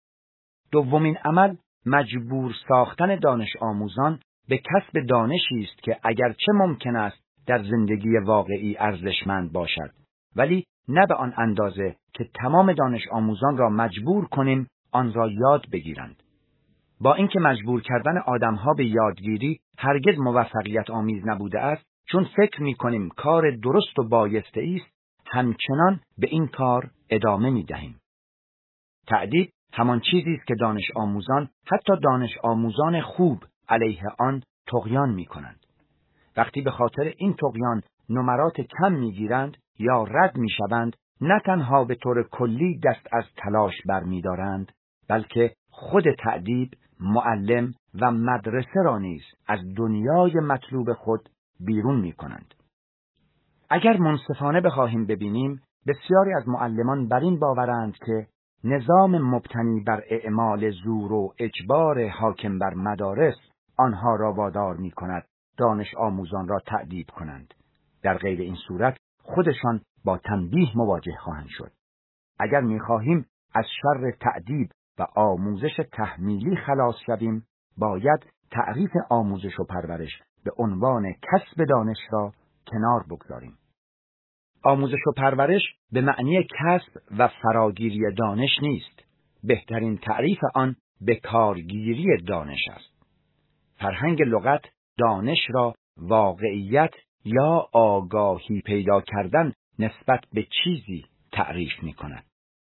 دومین عمل مجبور ساختن دانش آموزان به کسب دانشی است که اگرچه ممکن است در زندگی واقعی ارزشمند باشد، ولی نه به آن اندازه که تمام دانش آموزان را مجبور کنیم آن را یاد بگیرند. با اینکه مجبور کردن آدمها به یادگیری هرگز موفقیت آمیز نبوده است، چون فکر می‌کنیم کار درست و بایسته است، همچنان به این کار ادامه می‌دهیم. تأدیب همان چیزی است که دانش آموزان، حتی دانش آموزان خوب، علیه آن طغیان می‌کنند. وقتی به خاطر این طغیان نمرات کم می‌گیرند یا رد می‌شوند، نه تنها به طور کلی دست از تلاش برمی‌دارند، بلکه خود تأدیب، معلم و مدرسه را نیز از دنیای مطلوب خود بیرون می‌کنند. اگر منصفانه بخواهیم ببینیم، بسیاری از معلمان بر این باورند که نظام مبتنی بر اعمال زور و اجبار حاکم بر مدارس آنها را وادار می‌کند دانش آموزان را تأدیب کنند. در غیر این صورت خودشان با تنبیه مواجه خواهند شد. اگر می‌خواهیم از شر تأدیب و آموزش تحمیلی خلاص شویم، باید تعریف آموزش و پرورش به عنوان کسب دانش را کنار بگذاریم. آموزش و پرورش به معنی کسب و فراگیری دانش نیست. بهترین تعریف آن به کارگیری دانش است. فرهنگ لغت دانش را واقعیت یا آگاهی پیدا کردن نسبت به چیزی تعریف می کند.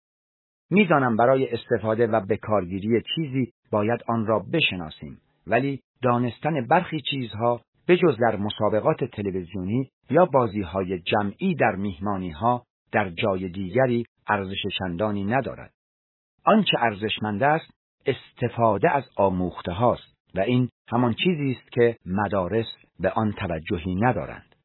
می دانم برای استفاده و به کارگیری چیزی باید آن را بشناسیم، ولی دانستن برخی چیزها به جز در مسابقات تلویزیونی یا بازی‌های جمعی در میهمانی‌ها در جای دیگری ارزش چندانی ندارد. آنچه ارزشمند است استفاده از آموخته هاست و این همان چیزی است که مدارس به آن توجهی ندارند.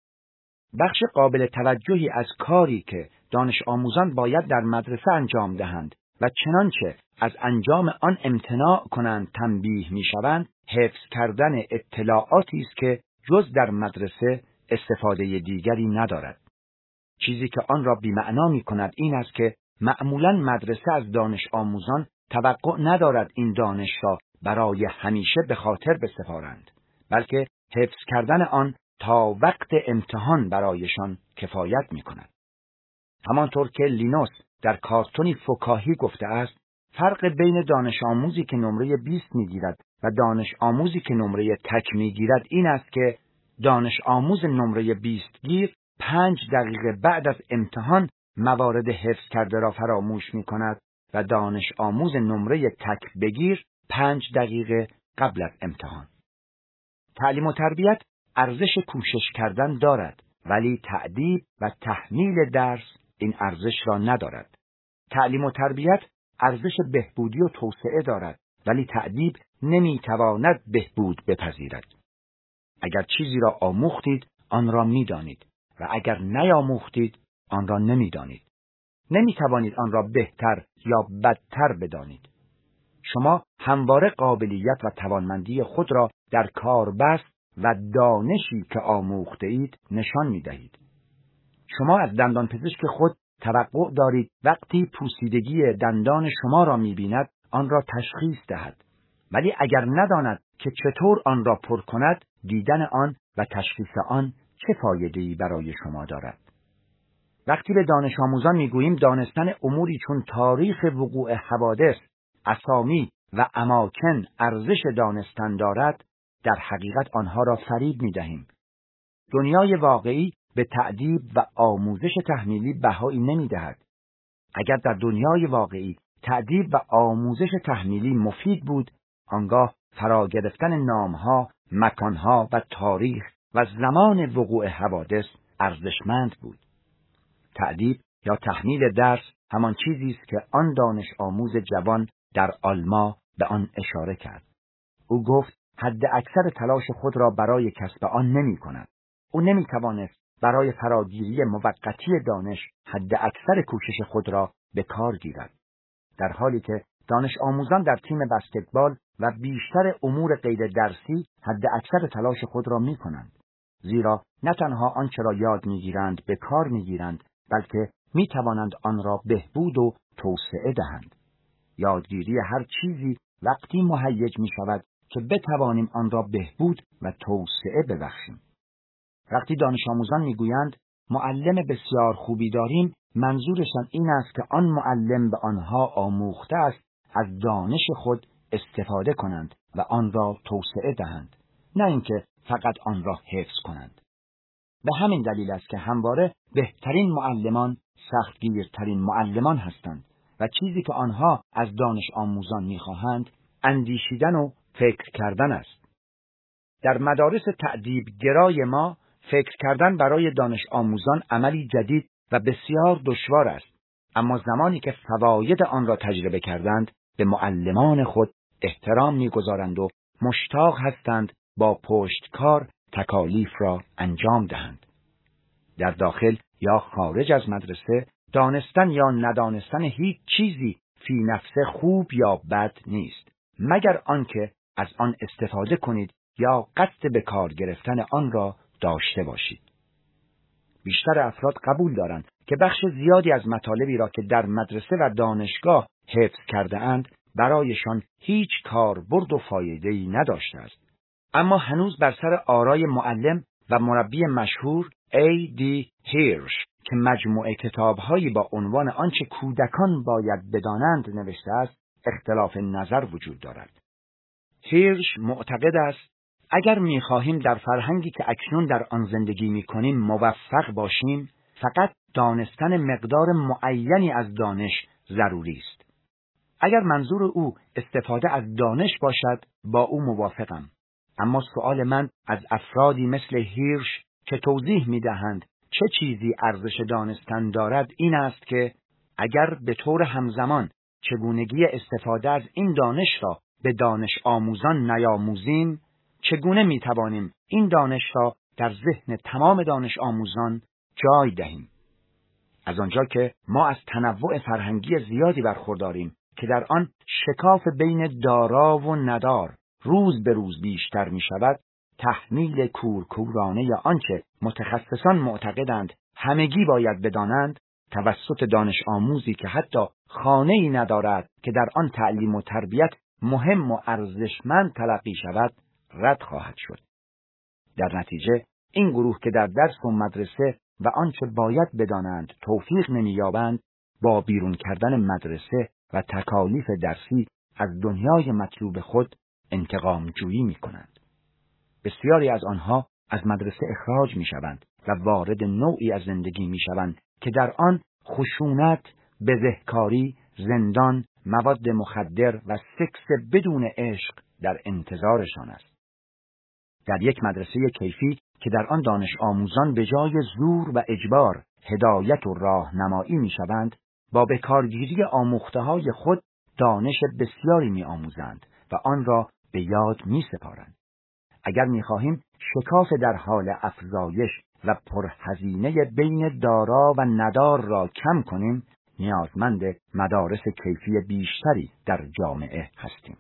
بخش قابل توجهی از کاری که دانش آموزان باید در مدرسه انجام دهند و چنانچه از انجام آن امتناع کنند تنبیه می‌شوند، حفظ کردن اطلاعاتی است که جز در مدرسه استفاده دیگری ندارد. چیزی که آن را بی‌معنا می‌کند این است که معمولاً مدرسه از دانش آموزان توقع ندارد این دانش را برای همیشه به خاطر بسپارند، بلکه حفظ کردن آن تا وقت امتحان برایشان کفایت می‌کند. همانطور که لینوس در کارتونی فکاهی گفته است، فرق بین دانش آموزی که نمره بیست می‌گیرد و دانش آموزی که نمره تک می‌گیرد این است که دانش آموز نمره بیست گیر پنج دقیقه بعد از امتحان موارد حفظ کرده را فراموش می‌کند و دانش آموز نمره تک بگیر پنج دقیقه قبل از امتحان. تعلیم و تربیت ارزش کوشش کردن دارد، ولی تأدیب و تحمیل درس این ارزش را ندارد. تعلیم و تربیت ارزش بهبودی و توسعه دارد، ولی تأدیب نمیتواند بهبود بپذیرد. اگر چیزی را آموختید آن را میدانید و اگر نیاموختید آن را نمیدانید. نمیتوانید آن را بهتر یا بدتر بدانید. شما همواره قابلیت و توانمندی خود را در کاربست و دانشی که آموخته اید نشان میدهید. شما از دندان پزشک خود توقع دارید وقتی پوسیدگی دندان شما را می‌بیند آن را تشخیص دهد، ولی اگر نداند که چطور آن را پر کند، دیدن آن و تشخیص آن چه فایده‌ای برای شما دارد. وقتی به دانش آموزان میگوییم دانستن اموری چون تاریخ وقوع حوادث، اسامی و اماکن ارزش دانستن دارد، در حقیقت آنها را فریب می‌دهیم. دنیای واقعی به تأدیب و آموزش تحمیلی بهایی نمی‌دهد. اگر در دنیای واقعی تأدیب و آموزش تحمیلی مفید بود، آنگاه فرا گرفتن نام‌ها، مکان‌ها و تاریخ و زمان وقوع حوادث ارزشمند بود. تأدیب یا تحمیل درس همان چیزی است که آن دانش آموز جوان در آلما به آن اشاره کرد. او گفت حد اکثر تلاش خود را برای کسب آن نمی کند. او نمی توانست برای فراگیری موقتی دانش حد اکثر کوشش خود را به کار گیرد. در حالی که دانش آموزان در تیم بسکتبال و بیشتر امور غیر درسی حد اکثر تلاش خود را می کنند. زیرا نه تنها آنچه را یاد می گیرند به کار می گیرند، بلکه می توانند آن را بهبود و توسعه دهند. یادگیری هر چیزی وقتی مهیج می شود که بتوانیم آن را بهبود و توسعه ببخشیم. وقتی دانش آموزان می گویند معلم بسیار خوبی داریم، منظورشان این است که آن معلم به آنها آموخته است از دانش خود استفاده کنند و آن را توسعه دهند، نه اینکه فقط آن را حفظ کنند. به همین دلیل است که همواره بهترین معلمان سختگیرترین معلمان هستند و چیزی که آنها از دانش آموزان می‌خواهند اندیشیدن و فکر کردن است. در مدارس تأدیب گرای ما فکر کردن برای دانش آموزان عملی جدید و بسیار دشوار است، اما زمانی که فواید آن را تجربه کردند به معلمان خود احترام می‌گذارند و مشتاق هستند با پشتکار تکالیف را انجام دهند. در داخل یا خارج از مدرسه دانستن یا ندانستن هیچ چیزی فی نفسه خوب یا بد نیست، مگر آنکه از آن استفاده کنید یا قصد به کار گرفتن آن را داشته باشید. بیشتر افراد قبول دارند که بخش زیادی از مطالبی را که در مدرسه و دانشگاه حفظ کرده اند برایشان هیچ کاربرد و فایده‌ای نداشته است. اما هنوز بر سر آرای معلم و مربی مشهور ای دی هیرش که مجموعه کتاب‌هایی با عنوان آنچه کودکان باید بدانند نوشته است، اختلاف نظر وجود دارد. هیرش معتقد است اگر می‌خواهیم در فرهنگی که اکنون در آن زندگی می‌کنیم موفق باشیم، فقط دانستن مقدار معینی از دانش ضروری است. اگر منظور او استفاده از دانش باشد، با او موافقم. اما سؤال من از افرادی مثل هیرش که توضیح می‌دهند چه چیزی ارزش دانستن دارد این است که اگر به طور همزمان چگونگی استفاده از این دانش را به دانش آموزان نیاموزیم، چگونه می‌توانیم این دانش را در ذهن تمام دانش آموزان جای دهیم؟ از آنجا که ما از تنوع فرهنگی زیادی برخورداریم که در آن شکاف بین دارا و ندار روز به روز بیشتر می شود، تحمیل کورکورانه یا آنچه متخصصان معتقدند همگی باید بدانند توسط دانش آموزی که حتی خانه‌ای ندارد که در آن تعلیم و تربیت مهم و ارزشمند تلقی شود رد خواهد شد. در نتیجه این گروه که در درس و مدرسه و آنچه باید بدانند توفیق نمی‌یابند، با بیرون کردن مدرسه و تکالیف درسی از دنیای مطلوب خود انتقام جویی می‌کنند. بسیاری از آنها از مدرسه اخراج می‌شوند و وارد نوعی از زندگی می‌شوند که در آن خشونت، بزهکاری، زندان، مواد مخدر و سکس بدون عشق در انتظارشان است. در یک مدرسه کیفی که در آن دانش آموزان به جای زور و اجبار هدایت و راهنمایی می‌شوند، با بکارگیری آموخته‌های خود دانش بسیاری می‌آموزند و آن را به یاد می‌سپارند. اگر می‌خواهیم شکاف در حال افزایش و پرهزینه بین دارا و ندار را کم کنیم، نیازمند مدارس کیفی بیشتری در جامعه هستیم.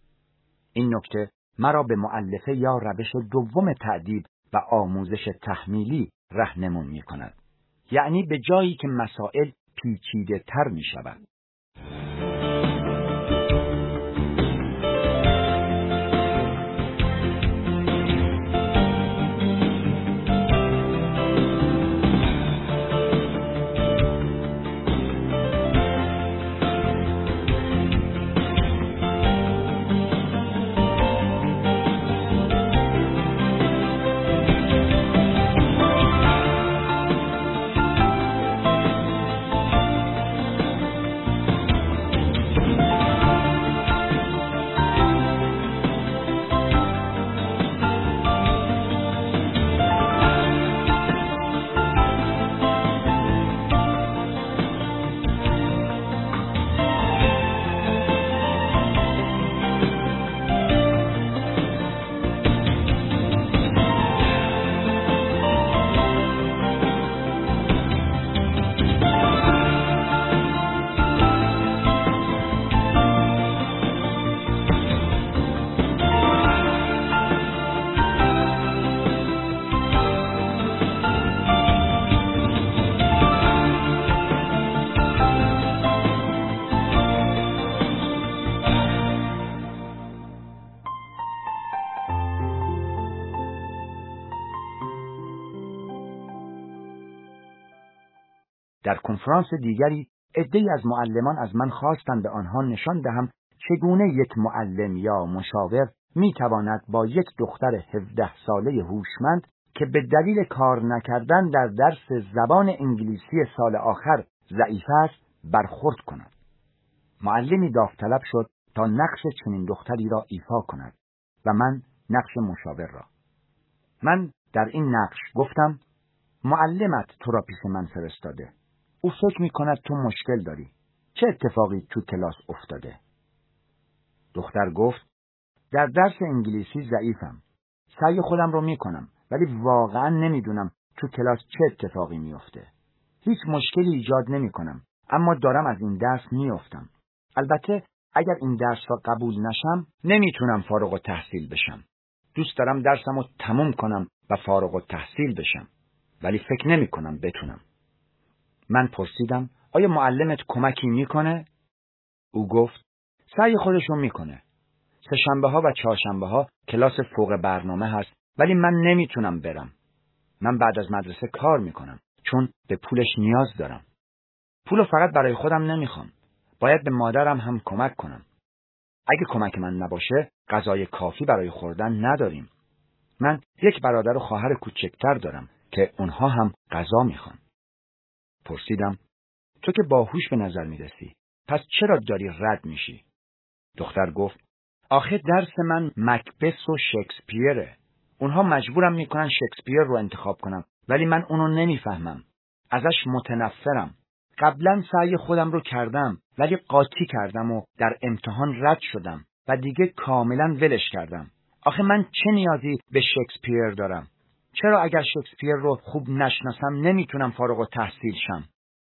این نکته مرا به مؤلفه یا روش دوم تأدیب و آموزش تحمیلی راهنمون می‌کند. یعنی به جایی که مسائل پیچیده تر می‌شود. در کنفرانس دیگری عده‌ای از معلمان از من خواستند به آنها نشان دهم چگونه یک معلم یا مشاور میتواند با یک دختر هفده ساله هوشمند که به دلیل کار نکردن در درس زبان انگلیسی سال آخر ضعیف است برخورد کند. معلمی داوطلب شد تا نقش چنین دختری را ایفا کند و من نقش مشاور را. من در این نقش گفتم معلمت تو را پیش من فرستاده. او فکر می کند تو مشکل داری. چه اتفاقی تو کلاس افتاده؟ دختر گفت در درس انگلیسی ضعیفم. سعی خودم رو می کنم ولی واقعا نمیدونم تو کلاس چه اتفاقی می افته. هیچ مشکلی ایجاد نمی کنم اما دارم از این درس می افتم. البته اگر این درس را قبول نشم نمیتونم فارغ التحصیل بشم. دوست دارم درسم رو تموم کنم و فارغ التحصیل بشم ولی فکر نمی کنم بتونم. من پرسیدم آیا معلمت کمکی میکنه؟ او گفت سعی خودشو میکنه. سه شنبه ها و چهارشنبه ها کلاس فوق برنامه هست ولی من نمیتونم برم. من بعد از مدرسه کار میکنم چون به پولش نیاز دارم. پولو فقط برای خودم نمیخوام. باید به مادرم هم کمک کنم. اگه کمک من نباشه غذای کافی برای خوردن نداریم. من یک برادر و خواهر کوچکتر دارم که اونها هم غذا میخوان. پرسیدم تو که باهوش به نظر میرسی پس چرا داری رد میشی؟ دختر گفت آخه درس من مکبث و شکسپیره. اونها مجبورم میکنن شکسپیر رو انتخاب کنم ولی من اونو نمیفهمم. ازش متنفرم. قبلا سعی خودم رو کردم ولی قاطی کردم و در امتحان رد شدم و دیگه کاملا ولش کردم. آخه من چه نیازی به شکسپیر دارم؟ چرا اگر شکسپیر رو خوب نشناسم نمیتونم فارغ التحصیل شم؟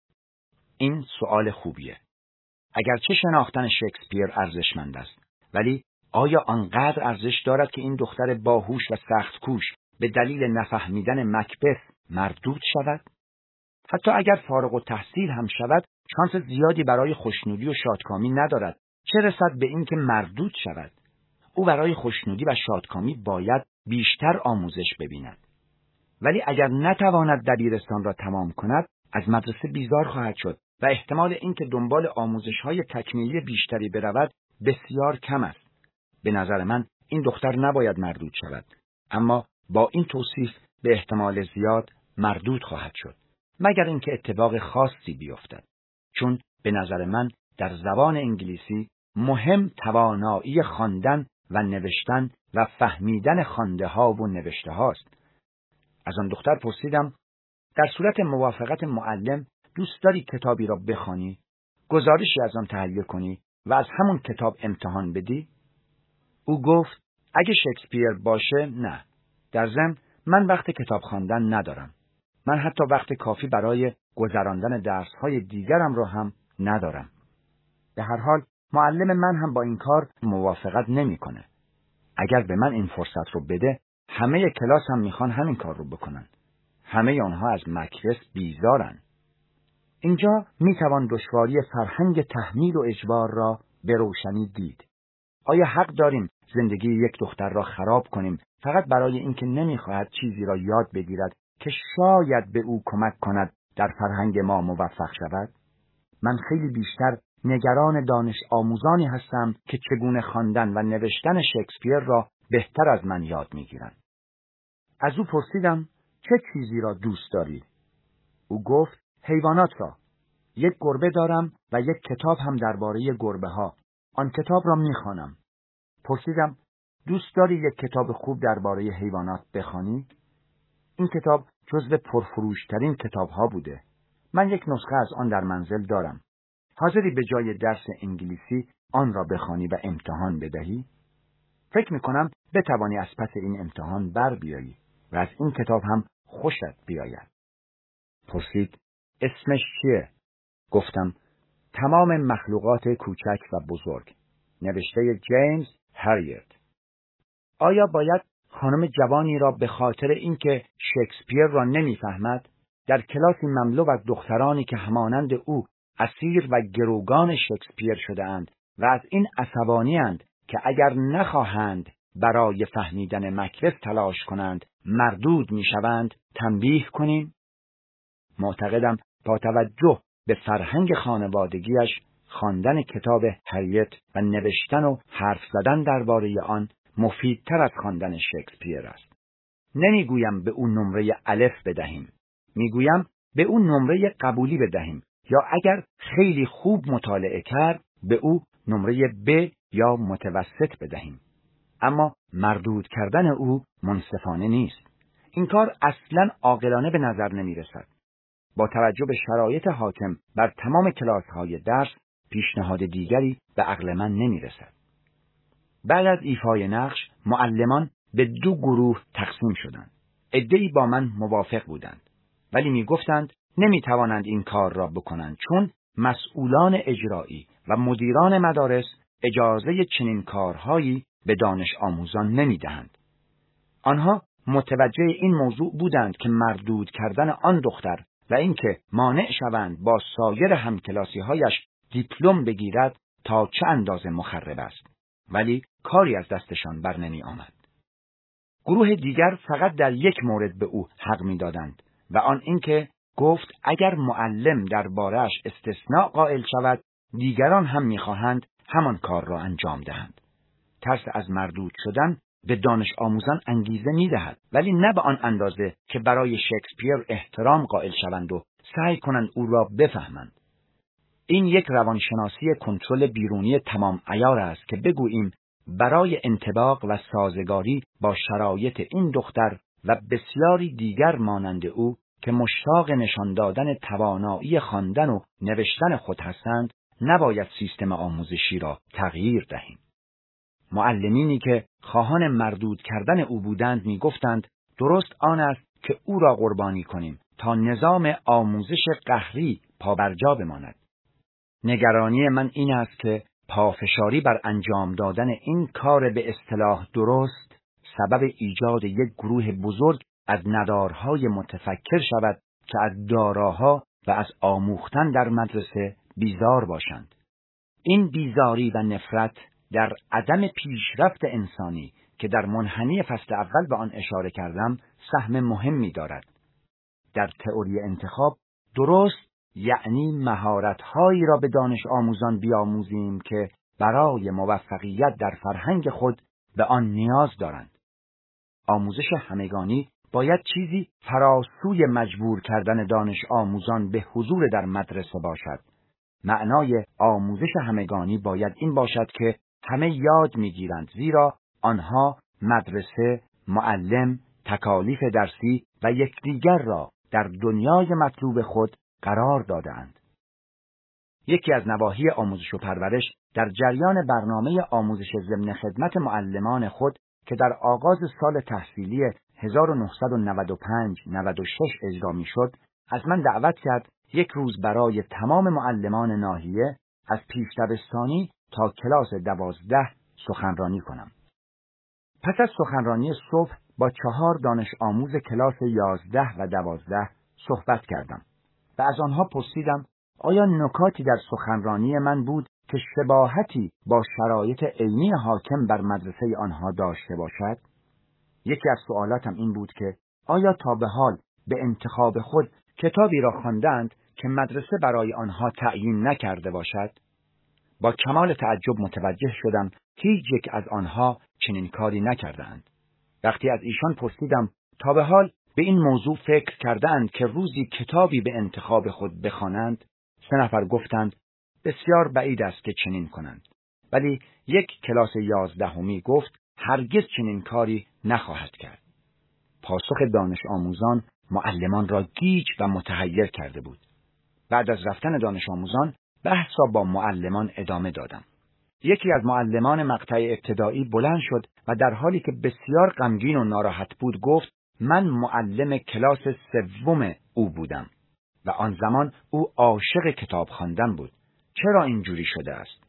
این سوال خوبیه. اگرچه شناختن شکسپیر ارزشمند است ولی آیا آنقدر ارزش دارد که این دختر باهوش و سخت کوش به دلیل نفهمیدن مکبث مردود شود؟ حتی اگر فارغ التحصیل هم شود شانس زیادی برای خوشنودی و شادکامی ندارد، چه رسد به این که مردود شود. او برای خوشنودی و شادکامی باید بیشتر آموزش ببیند. ولی اگر نتواند دبیرستان را تمام کند از مدرسه بیزار خواهد شد و احتمال اینکه دنبال آموزش‌های تکمیلی بیشتری برود بسیار کم است. به نظر من این دختر نباید مردود شود، اما با این توصیف به احتمال زیاد مردود خواهد شد، مگر اینکه اتفاق خاصی بیفتد. چون به نظر من در زبان انگلیسی مهم توانایی خواندن و نوشتن و فهمیدن خوانده ها و نوشته هاست. از آن دختر پرسیدم در صورت موافقت معلم دوست داری کتابی را بخوانی، گزارشی از آن تهیه کنی و از همون کتاب امتحان بدی؟ او گفت اگه شکسپیر باشه نه. در ضمن من وقت کتاب خواندن ندارم. من حتی وقت کافی برای گذراندن درس‌های دیگرم را هم ندارم. به هر حال معلم من هم با این کار موافقت نمی‌کنه. اگر به من این فرصت رو بده همه کلاس هم میخوان همین کار رو بکنن. همه آنها از مکبث بیزارن. اینجا میتوان دشواری فرهنگ تحمیل و اجبار را به روشنی دید. آیا حق داریم زندگی یک دختر را خراب کنیم فقط برای اینکه نمیخواهد چیزی را یاد بگیرد که شاید به او کمک کند در فرهنگ ما موفق شود؟ من خیلی بیشتر نگران دانش آموزانی هستم که چگونه خواندن و نوشتن شکسپیر را بهتر از من یاد میگیرند. از او پرسیدم چه چیزی را دوست داری؟ او گفت حیوانات را. یک گربه دارم و یک کتاب هم درباره گربه ها. آن کتاب را میخوانم. پرسیدم دوست داری یک کتاب خوب درباره حیوانات بخوانی؟ این کتاب جزو پرفروشترین کتاب ها بوده. من یک نسخه از آن در منزل دارم. حاضری به جای درس انگلیسی آن را بخوانی و امتحان بدهی؟ فکر میکنم بتوانی از پس این امتحان بر بیایی و از این کتاب هم خوشت بیاید. پرسید اسمش چیه؟ گفتم تمام مخلوقات کوچک و بزرگ، نوشته جیمز هریت. آیا باید خانم جوانی را به خاطر اینکه شکسپیر را نمیفهمد در کلاسی مملو از دخترانی که همانند او اسیر و گروگان شکسپیر شده اند و از این عصبانی اند که اگر نخواهند برای فهمیدن مکبث تلاش کنند مردود میشوند تنبیه کنیم؟ معتقدم با توجه به فرهنگ خانوادگیش خواندن کتاب هریت و نوشتن و حرف زدن درباره آن مفیدتر از خواندن شکسپیر است. نمیگویم به او نمره الف بدهیم، میگویم به او نمره قبولی بدهیم، یا اگر خیلی خوب مطالعه کرد به او نمره ب یا متوسط بدهیم. اما مردود کردن او منصفانه نیست. این کار اصلاً عاقلانه به نظر نمی رسد. با توجه به شرایط حاکم بر تمام کلاس‌های درس، پیشنهاد دیگری به عقل من نمی رسد. بعد از ایفای نقش، معلمان به دو گروه تقسیم شدند. عده‌ای با من موافق بودند، ولی می گفتند نمی توانند این کار را بکنند چون مسئولان اجرایی و مدیران مدارس اجازه چنین کارهایی به دانش آموزان نمی دهند. آنها متوجه این موضوع بودند که مردود کردن آن دختر و اینکه مانع شوند با سایر همکلاسی‌هایش دیپلم بگیرد تا چه اندازه مخرب است، ولی کاری از دستشان بر نمی آمد. گروه دیگر فقط در یک مورد به او حق می دادند و آن اینکه گفت اگر معلم درباره‌اش استثناء قائل شود، دیگران هم می خواهند همان کار را انجام دهند. ترس از مردود شدن به دانش آموزان انگیزه می دهد، ولی نه به آن اندازه که برای شکسپیر احترام قائل شوند و سعی کنند او را بفهمند. این یک روانشناسی کنترل بیرونی تمام عیار است که بگوییم برای انطباق و سازگاری با شرایط این دختر و بسیاری دیگر مانند او که مشتاق نشان دادن توانایی خواندن و نوشتن خود هستند، نباید سیستم آموزشی را تغییر دهیم. معلمینی که خواهان مردود کردن او بودند می گفتند درست آن است که او را قربانی کنیم تا نظام آموزش قهری پابرجا بماند. نگرانی من این است که پافشاری بر انجام دادن این کار به اصطلاح درست سبب ایجاد یک گروه بزرگ از ندارهای متفکر شود که از داراها و از آموختن در مدرسه بیزار باشند. این بیزاری و نفرت در عدم پیشرفت انسانی که در منحنی فصل اول به آن اشاره کردم سهم مهمی دارد. در تئوری انتخاب درست یعنی مهارت‌هایی را به دانش آموزان بیاموزیم که برای موفقیت در فرهنگ خود به آن نیاز دارند. آموزش همگانی باید چیزی فراسوی مجبور کردن دانش آموزان به حضور در مدرسه باشد. معنای آموزش همگانی باید این باشد که همه یاد می‌گیرند، زیرا آنها مدرسه، معلم، تکالیف درسی و یکدیگر را در دنیای مطلوب خود قرار دادند. یکی از نواحی آموزش و پرورش در جریان برنامه آموزش ضمن خدمت معلمان خود که در آغاز سال تحصیلی هزار و نهصد و نود و پنج نود و شش اجرا می‌شد، از من دعوت کرد یک روز برای تمام معلمان ناحیه از پیش دبستانی تا کلاس دوازده سخنرانی کنم. پس از سخنرانی صبح با چهار دانش آموز کلاس یازده و دوازده صحبت کردم و از آنها پرسیدم آیا نکاتی در سخنرانی من بود که شباهتی با شرایط علمی حاکم بر مدرسه آنها داشته باشد؟ یکی از سوالاتم این بود که آیا تا به حال به انتخاب خود کتابی را خواندند که مدرسه برای آنها تعیین نکرده باشد؟ با کمال تعجب متوجه شدم هیچ یک از آنها چنین کاری نکردند. وقتی از ایشان پرسیدم تا به حال به این موضوع فکر کردند که روزی کتابی به انتخاب خود بخوانند، سه نفر گفتند بسیار بعید است که چنین کنند. ولی یک کلاس یازدهمی گفت هرگز چنین کاری نخواهد کرد. پاسخ دانش آموزان معلمان را گیج و متحیر کرده بود. بعد از رفتن دانش آموزان بحث را با معلمان ادامه دادم. یکی از معلمان مقطع ابتدایی بلند شد و در حالی که بسیار غمگین و ناراحت بود گفت من معلم کلاس سوم او بودم و آن زمان او عاشق کتاب خواندن بود. چرا اینجوری شده است؟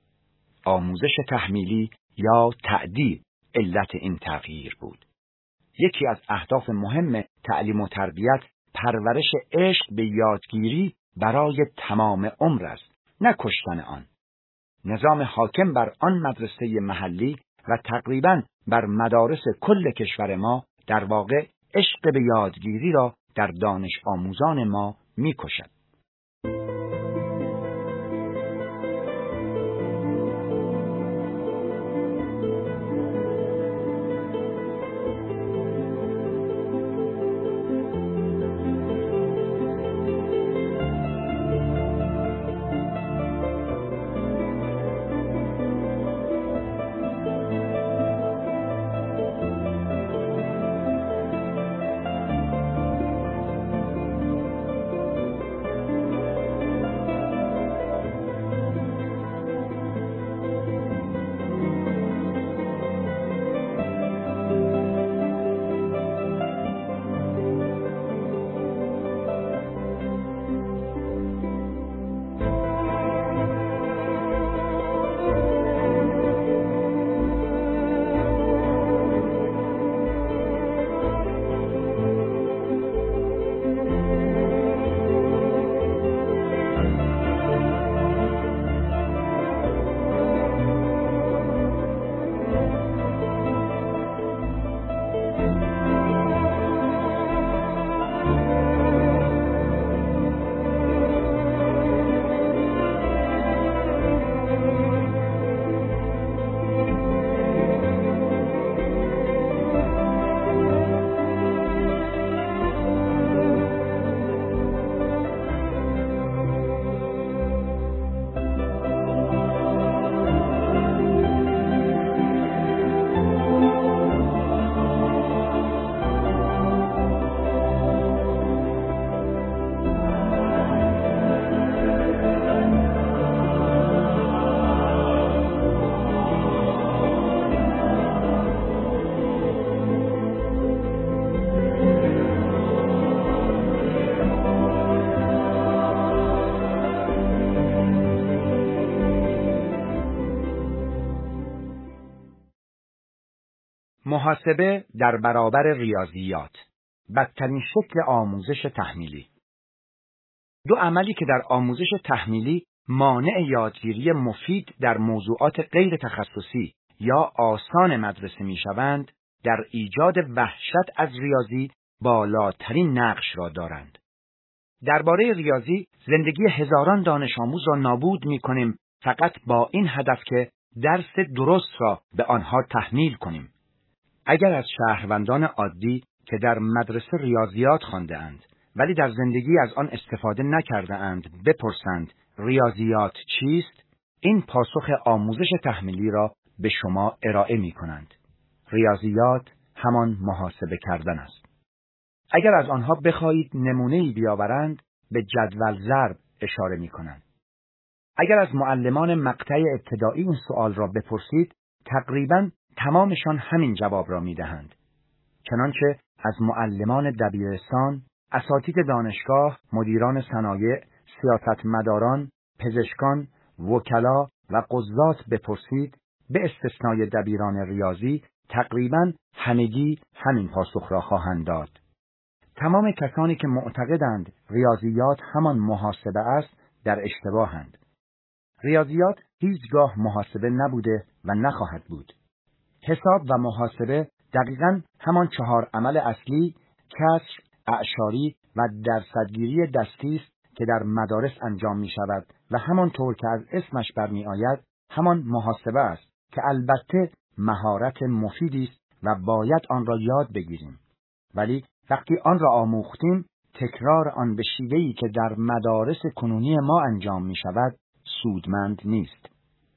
آموزش تحمیلی یا تعدیل علت این تغییر بود. یکی از اهداف مهم تعلیم و تربیت پرورش عشق به یادگیری برای تمام عمر است، نه کشتن آن. نظام حاکم بر آن مدرسه محلی و تقریباً بر مدارس کل کشور ما در واقع عشق به یادگیری را در دانش آموزان ما می کشد. محاسبه در برابر ریاضیات، بدترین شکل آموزش تحمیلی. دو عملی که در آموزش تحمیلی مانع یادگیری مفید در موضوعات غیر تخصصی یا آسان مدرسه میشوند، در ایجاد وحشت از ریاضی بالاترین نقش را دارند. درباره ریاضی زندگی هزاران دانش آموز را نابود می‌کنیم فقط با این هدف که درس درست را به آنها تحمیل کنیم. اگر از شهروندان عادی که در مدرسه ریاضیات خوانده‌اند ولی در زندگی از آن استفاده نکرده‌اند بپرسند ریاضیات چیست، این پاسخ آموزش تحمیلی را به شما ارائه می‌کنند. ریاضیات همان محاسبه کردن است. اگر از آنها بخواهید نمونه‌ای بیاورند به جدول ضرب اشاره می‌کنند. اگر از معلمان مقطع ابتدایی این سوال را بپرسید، تقریباً تمامشان همین جواب را می‌دهند. چنانچه از معلمان دبیرستان، اساتید دانشگاه، مدیران صنایع، سیاستمداران، پزشکان، وکلا و قضات بپرسید، به استثنای دبیران ریاضی، تقریباً همگی همین پاسخ را خواهند داد. تمام کسانی که معتقدند ریاضیات همان محاسبه است، در اشتباهند. ریاضیات هیچگاه محاسبه نبوده و نخواهد بود. حساب و محاسبه دقیقاً همان چهار عمل اصلی، کسر، اعشاری و درصدگیری دستی است که در مدارس انجام می شود و همانطور که از اسمش برمی آید همان محاسبه است که البته مهارت مفیدی است و باید آن را یاد بگیریم. ولی وقتی آن را آموختیم، تکرار آن به شیوهی که در مدارس کنونی ما انجام می شود سودمند نیست.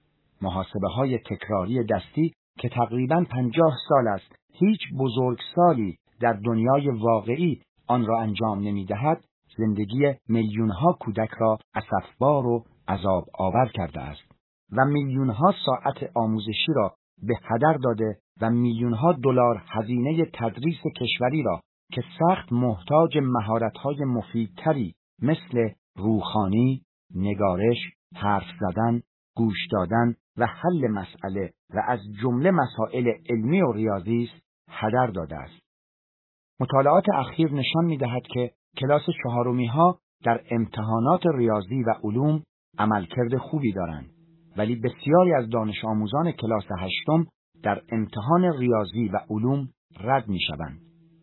محاسبه های تکراری دستی که تقریباً پنجاه سال است هیچ بزرگسالی در دنیای واقعی آن را انجام نمی دهد، زندگی میلیونها کودک را اسفبار و عذاب آور کرده است و میلیونها ساعت آموزشی را به هدر داده و میلیونها دلار هزینه تدریس کشوری را که سخت محتاج مهارت‌های مفیدتری مثل روخوانی، نگارش، حرف زدن، گوش دادن و حل مسئله و از جمله مسائل علمی و ریاضی است هدر داده است. مطالعات اخیر نشان می‌دهد که کلاس چهارمی‌ها در امتحانات ریاضی و علوم عملکرد خوبی دارند، ولی بسیاری از دانش آموزان کلاس هشتم در امتحان ریاضی و علوم رد می‌شوند.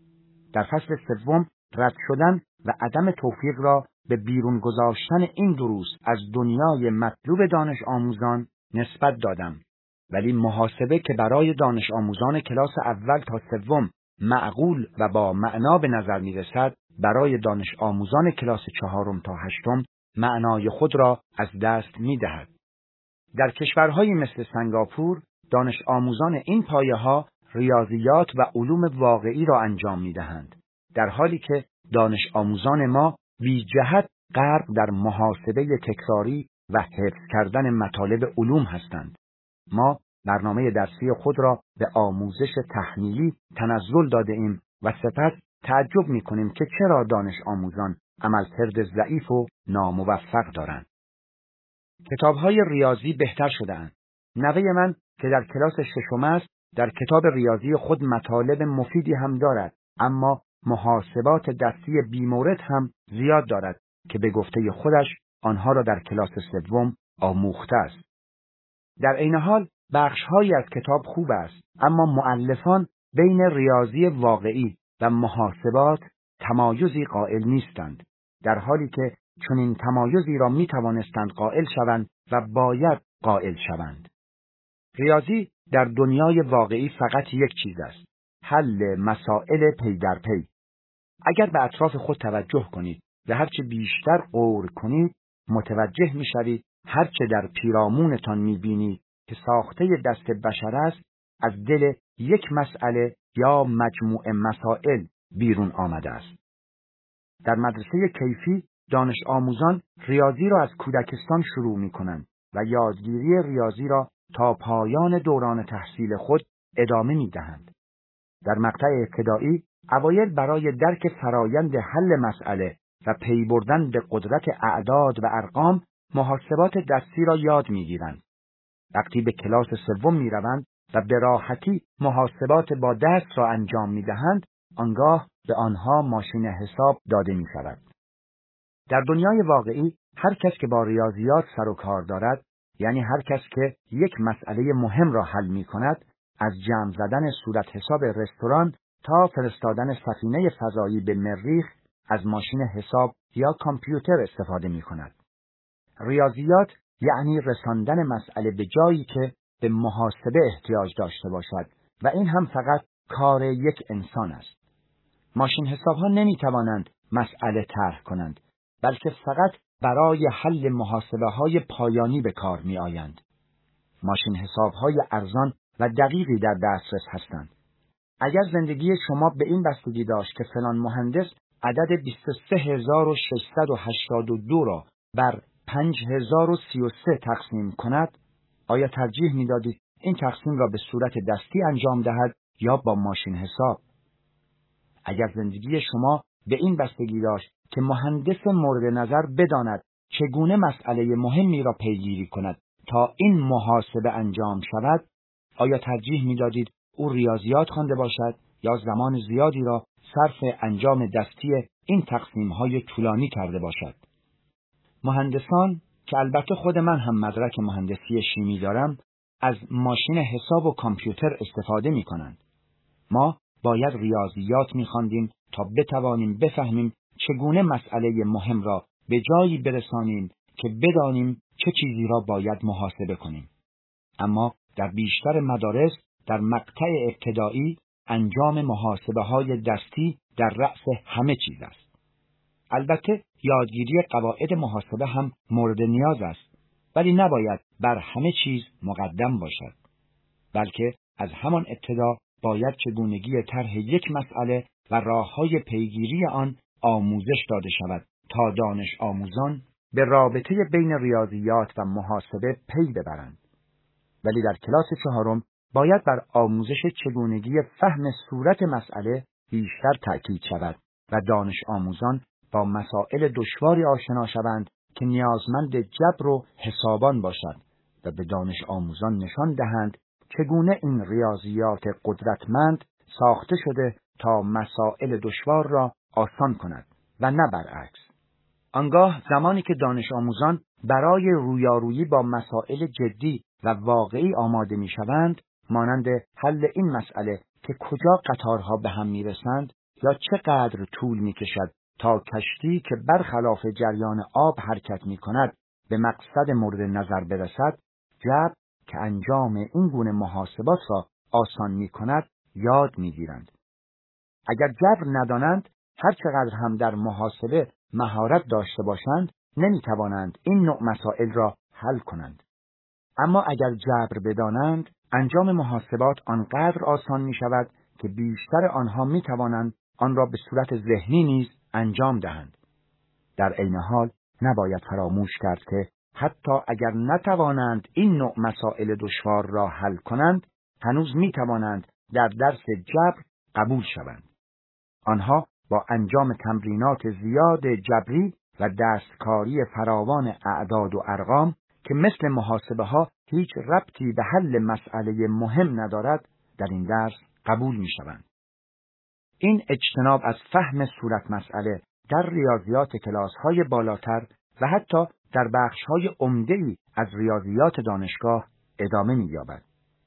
در فصل سوم رد شدن و عدم توفیق را به بیرون گذاشتن این دروس از دنیای مطلوب دانش آموزان نسبت دادم، ولی محاسبه که برای دانش آموزان کلاس اول تا سوم معقول و با معنا به نظر می رسد، برای دانش آموزان کلاس چهارم تا هشتم معنای خود را از دست می دهد. در کشورهایی مثل سنگاپور، دانش آموزان این پایه ها ریاضیات و علوم واقعی را انجام می دهند، در حالی که دانش آموزان ما بی جهت غرق در محاسبه تکراری و حفظ کردن مطالب علوم هستند. ما برنامه درسی خود را به آموزش تحمیلی تنزل داده ایم و سپس تعجب می کنیم که چرا دانش آموزان عملکرد ضعیف و ناموفق دارند. کتاب‌های ریاضی بهتر شده‌اند. نوه من که در کلاس ششم است، در کتاب ریاضی خود مطالب مفیدی هم دارد، اما محاسبات دستی بیمورد هم زیاد دارد که به گفته خودش آنها را در کلاس سوم آموخته است. در عین حال بخش‌هایی از کتاب خوب است، اما مؤلفان بین ریاضی واقعی و محاسبات تمایزی قائل نیستند، در حالی که چنین تمایزی را می توانستند قائل شوند و باید قائل شوند. ریاضی در دنیای واقعی فقط یک چیز است: حل مسائل پی در پی. اگر به اطراف خود توجه کنید و هرچه بیشتر غور کنید، متوجه می شوید هرچه در پیرامونتان می بینید که ساخته دست بشر است، از دل یک مسئله یا مجموعه مسائل بیرون آمده است. در مدرسه کیفی دانش آموزان ریاضی را از کودکستان شروع می کنند و یادگیری ریاضی را تا پایان دوران تحصیل خود ادامه می دهند. در مقطع ابتدایی اوایل برای درک فرایند حل مسئله و پی بردن به قدرت اعداد و ارقام محاسبات دستی را یاد می گیرند. وقتی به کلاس سوم می روند و به راحتی محاسبات با دست را انجام می‌دهند، آنگاه به آنها ماشین حساب داده می‌شود. در دنیای واقعی هر کس که با ریاضیات سر و کار دارد، یعنی هر کس که یک مسئله مهم را حل می‌کند، از جمع زدن صورت حساب رستوران تا فرستادن سفینه فضایی به مریخ از ماشین حساب یا کامپیوتر استفاده می‌کند. ریاضیات یعنی رساندن مسئله به جایی که به محاسبه احتیاج داشته باشد و این هم فقط کار یک انسان است. ماشین حساب‌ها نمی‌توانند مسئله طرح کنند، بلکه فقط برای حل محاسبه‌های پایانی به کار می‌آیند. ماشین حساب‌های ارزان و دقیقی در دسترس هستند. اگر زندگی شما به این بستگی داشت که فلان مهندس عدد بیست و سه هزار و ششصد و هشتاد و دو را بر پنج هزار و سی و سه تقسیم کند، آیا ترجیح می‌دادید این تقسیم را به صورت دستی انجام دهد یا با ماشین حساب؟ اگر زندگی شما به این بستگی داشت که مهندس مورد نظر بداند چگونه مسئله مهمی را پیگیری کند تا این محاسبه انجام شود، آیا ترجیح می‌دادید او ریاضیات خوانده باشد یا زمان زیادی را صرف انجام دستی این تقسیم‌های طولانی کرده باشد؟ مهندسان که البته خود من هم مدرک مهندسی شیمی دارم، از ماشین حساب و کامپیوتر استفاده می‌کنند. ما باید ریاضیات می‌خواندیم تا بتوانیم بفهمیم چگونه مسئله مهم را به جایی برسانیم که بدانیم چه چیزی را باید محاسبه کنیم. اما در بیشتر مدارس در مقطع ابتدایی انجام محاسبه‌های دستی در رأس همه چیز است. البته یادگیری قواعد محاسبه هم مورد نیاز است، ولی نباید بر همه چیز مقدم باشد، بلکه از همان ابتدا باید چگونگی طرح یک مسئله و راه‌های پیگیری آن آموزش داده شود تا دانش آموزان به رابطه بین ریاضیات و محاسبه پی ببرند. ولی در کلاس چهارم باید بر آموزش چگونگی فهم صورت مسئله بیشتر تأکید شود و دانش آموزان با مسائل دشواری آشنا شوند که نیازمند جبر و حسابان باشد و به دانش آموزان نشان دهند چگونه این ریاضیات قدرتمند ساخته شده تا مسائل دشوار را آسان کند و نه برعکس. آنگاه زمانی که دانش آموزان برای رویارویی با مسائل جدی و واقعی آماده می شوند، مانند حل این مسئله که کجا قطارها به هم می رسند یا چقدر طول می کشد تا کشتی که برخلاف جریان آب حرکت می کند به مقصد مورد نظر برسد، جبر که انجام این گونه محاسبات را آسان می کند یاد می گیرند. اگر جبر ندانند، هر چقدر هم در محاسبه مهارت داشته باشند، نمی توانند این نوع مسائل را حل کنند. اما اگر جبر بدانند، انجام محاسبات آنقدر آسان می شود که بیشتر آنها می توانند آن را به صورت ذهنی نیز انجام دهند. در عین حال نباید فراموش کرد که حتی اگر نتوانند این نوع مسائل دشوار را حل کنند، هنوز می توانند در درس جبر قبول شوند. آنها با انجام تمرینات زیاد جبری و دستکاری فراوان اعداد و ارقام که مثل محاسبه ها هیچ ربطی به حل مسئله مهم ندارد، در این درس قبول می شوند. این اجتناب از فهم صورت مسئله در ریاضیات کلاس های بالاتر و حتی در بخش های عمده‌ای از ریاضیات دانشگاه ادامه می یابد.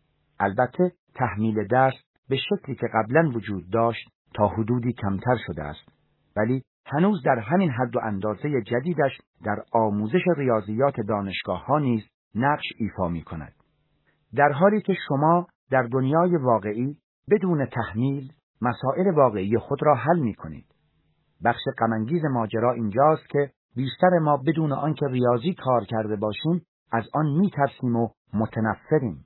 البته تحمیل درس به شکلی که قبلا وجود داشت تا حدودی کمتر شده است، ولی هنوز در همین حد و اندازه جدیدش در آموزش ریاضیات دانشگاه ها نیز نقش ایفا می کند. در حالی که شما در دنیای واقعی بدون تحمیل مسائل واقعی خود را حل می کنید. بخش غم‌انگیز ماجرا اینجاست که بیشتر ما بدون آنکه ریاضی کار کرده باشیم از آن می ترسیم و متنفریم.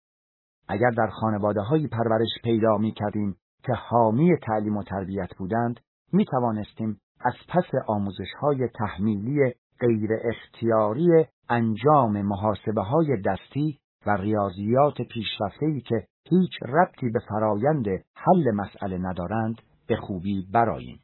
اگر در خانواده‌های پرورش پیدا می کردیم که حامی تعلیم و تربیت بودند، می توانستیم از پس آموزش‌های تحمیلی غیر اختیاری انجام محاسبه‌های دستی و ریاضیات پیشرفته‌ای که هیچ ربطی به فرایند حل مسئله ندارند به خوبی برآییم.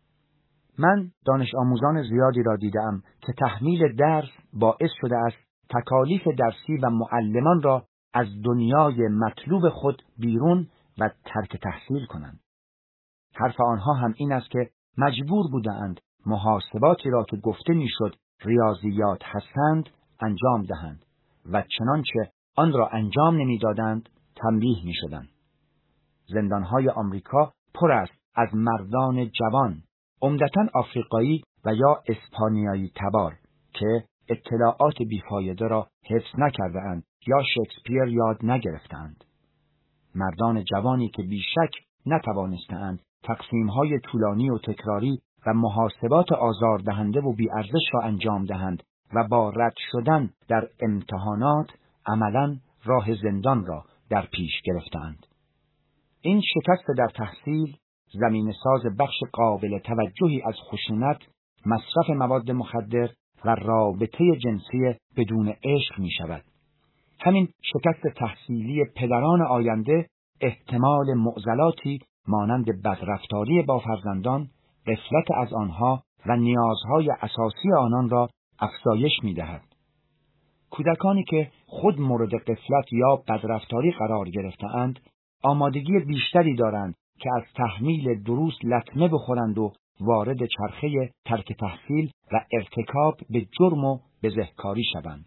من دانش آموزان زیادی را دیدم که تحمیل درس باعث شده است تکالیف درسی و معلمان را از دنیای مطلوب خود بیرون و ترک تحصیل کنند. حرف آنها هم این است که مجبور بودند محاسباتی را که گفته میشد ریاضیات هستند انجام دهند و چنانچه آن را انجام نمیدادند تنبیه میشدند. زندانهای آمریکا پر است از مردان جوان، عمدتاً آفریقایی و یا اسپانیایی تبار که اطلاعات بیفایده را حفظ نکرده اند یا شکسپیر یاد نگرفتند. مردان جوانی که بیشک نتوانستند تقسیم‌های طولانی و تکراری و محاسبات آزاردهنده و بی‌ارزش را انجام دهند و با رد شدن در امتحانات عملاً راه زندان را در پیش گرفتند. این شکست در تحصیل زمین ساز بخش قابل توجهی از خشونت، مصرف مواد مخدر و رابطه جنسی بدون عشق می شود. همین شکست تحصیلی پدران آینده احتمال معضلاتی مانند بدرفتاری با فرزندان، غفلت از آنها و نیازهای اساسی آنان را افزایش می دهد. کودکانی که خود مورد غفلت یا بدرفتاری قرار گرفته‌اند، آمادگی بیشتری دارند که از تحمیل دروس لطمه بخورند و وارد چرخه ترک تحصیل و ارتکاب به جرم و بزهکاری شوند.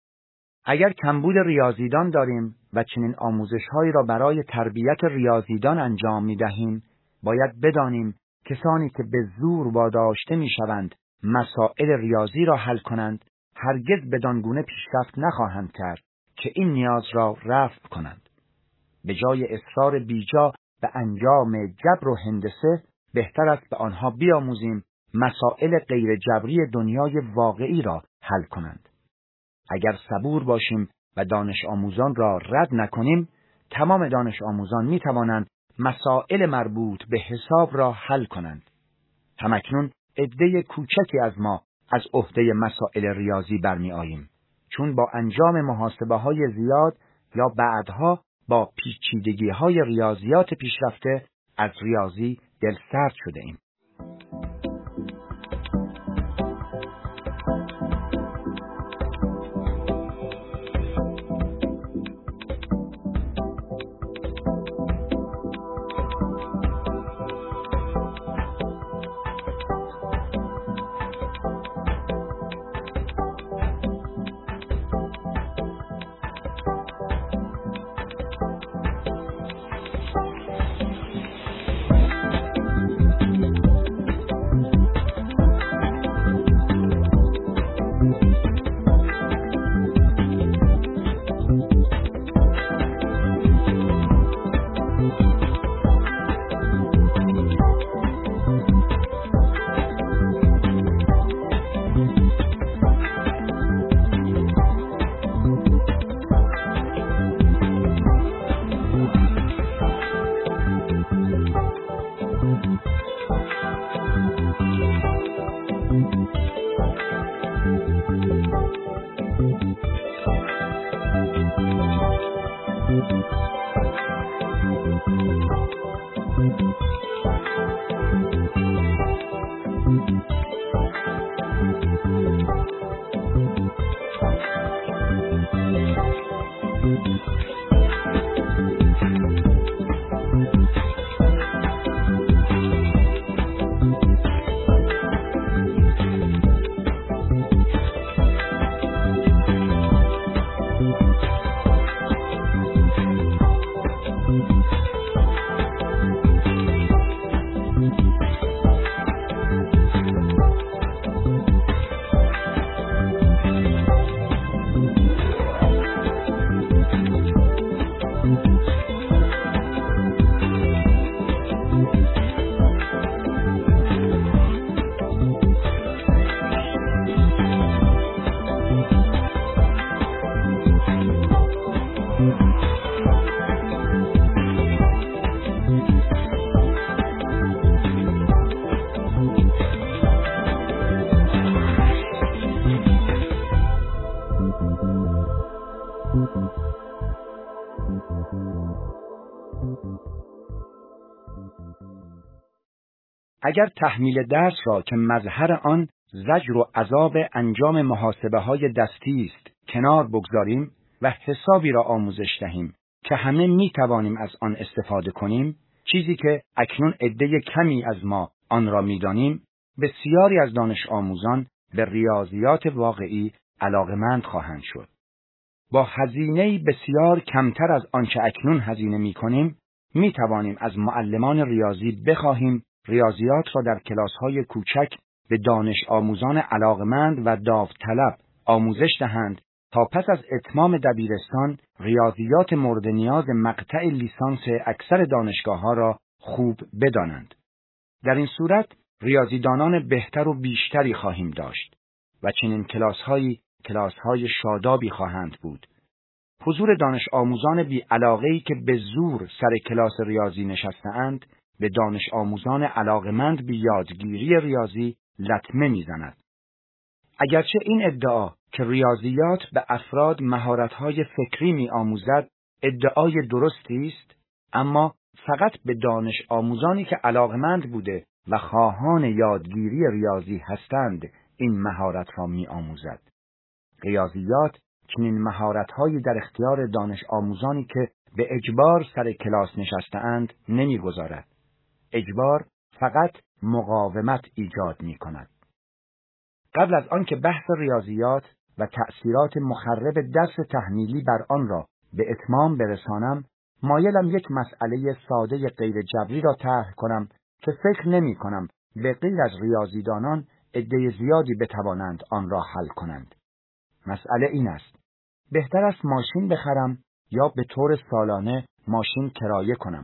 اگر کمبود ریاضیدان داریم و چنین آموزش‌هایی را برای تربیت ریاضیدان انجام می‌دهیم، باید بدانیم کسانی که به زور واداشته می‌شوند مسائل ریاضی را حل کنند، هرگز بدان گونه پیشرفت نخواهند کرد که این نیاز را رفع کنند. به جای اصرار بیجا به انجام جبر و هندسه، بهتر است به آنها بیاموزیم مسائل غیر جبری دنیای واقعی را حل کنند. اگر صبور باشیم و دانش آموزان را رد نکنیم، تمام دانش آموزان می توانند مسائل مربوط به حساب را حل کنند. همکنون عده کوچکی از ما از عهده مسائل ریاضی برمی آییم، چون با انجام محاسبه های زیاد یا بعدها با پیچیدگی های ریاضیات پیشرفته از ریاضی دلسرد شده ایم. اگر تحمیل درس را که مظهر آن زجر و عذاب انجام محاسبه های دستی است کنار بگذاریم و حسابی را آموزش دهیم که همه می توانیم از آن استفاده کنیم، چیزی که اکنون عده کمی از ما آن را می دانیم، بسیاری از دانش آموزان به ریاضیات واقعی علاقمند خواهند شد. با هزینه‌ای بسیار کمتر از آنچه اکنون هزینه می کنیم، می توانیم از معلمان ریاضی بخواهیم ریاضیات را در کلاس‌های کوچک به دانش آموزان علاقمند و داوطلب آموزش دهند تا پس از اتمام دبیرستان ریاضیات مورد نیاز مقطع لیسانس اکثر دانشگاه‌ها را خوب بدانند. در این صورت ریاضیدانان بهتر و بیشتری خواهیم داشت و چنین کلاس‌هایی کلاس‌های شادابی خواهند بود. حضور دانش آموزان بی علاقه‌ای که به زور سر کلاس ریاضی نشسته‌اند به دانش آموزان علاقمند به یادگیری ریاضی لطمه می‌زند. اگرچه این ادعا که ریاضیات به افراد مهارت‌های فکری می‌آموزد ادعای درستی است، اما فقط به دانش آموزانی که علاقمند بوده و خواهان یادگیری ریاضی هستند این مهارت را می‌آموزد. ریاضیات چنین مهارت‌هایی در اختیار دانش آموزانی که به اجبار سر کلاس نشسته‌اند نمی‌گذارد. اجبار فقط مقاومت ایجاد می‌کند. قبل از آن که بحث ریاضیات و تأثیرات مخرب درس تحمیلی بر آن را به اتمام برسانم، مایلم یک مسئله ساده غیر جبری را طرح کنم که فکر نمی کنم به غیر از ریاضیدانان عده زیادی بتوانند آن را حل کنند. مسئله این است: بهتر است ماشین بخرم یا به طور سالانه ماشین کرایه کنم؟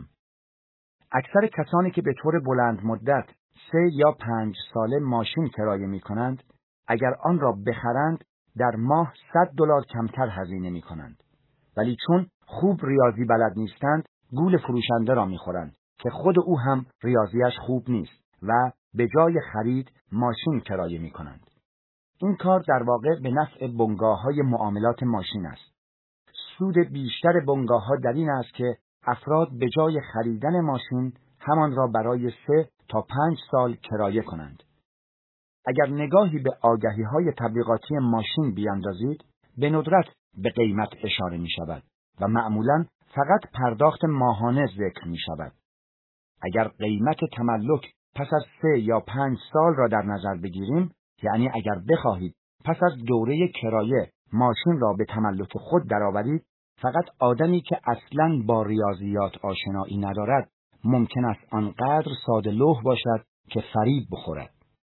اکثر کسانی که به طور بلند مدت سه یا پنج ساله ماشین کرایه می کنند، اگر آن را بخرند در ماه صد دلار کمتر هزینه می کنند. ولی چون خوب ریاضی بلد نیستند، گول فروشنده را می خورند که خود او هم ریاضیش خوب نیست و به جای خرید ماشین کرایه می کنند. این کار در واقع به نفع بنگاه‌های معاملات ماشین است. سود بیشتر بنگاه‌ها در این است که افراد به جای خریدن ماشین همان را برای سه تا پنج سال کرایه کنند. اگر نگاهی به آگهی‌های تبلیغاتی ماشین بیاندازید، به ندرت به قیمت اشاره می شود و معمولاً فقط پرداخت ماهانه ذکر می شود. اگر قیمت تملک پس از سه یا پنج سال را در نظر بگیریم، یعنی اگر بخواهید پس از دوره کرایه ماشین را به تملک خود درآورید، فقط آدمی که اصلاً با ریاضیات آشنایی ندارد ممکن است آنقدر ساده لوح باشد که فریب بخورد.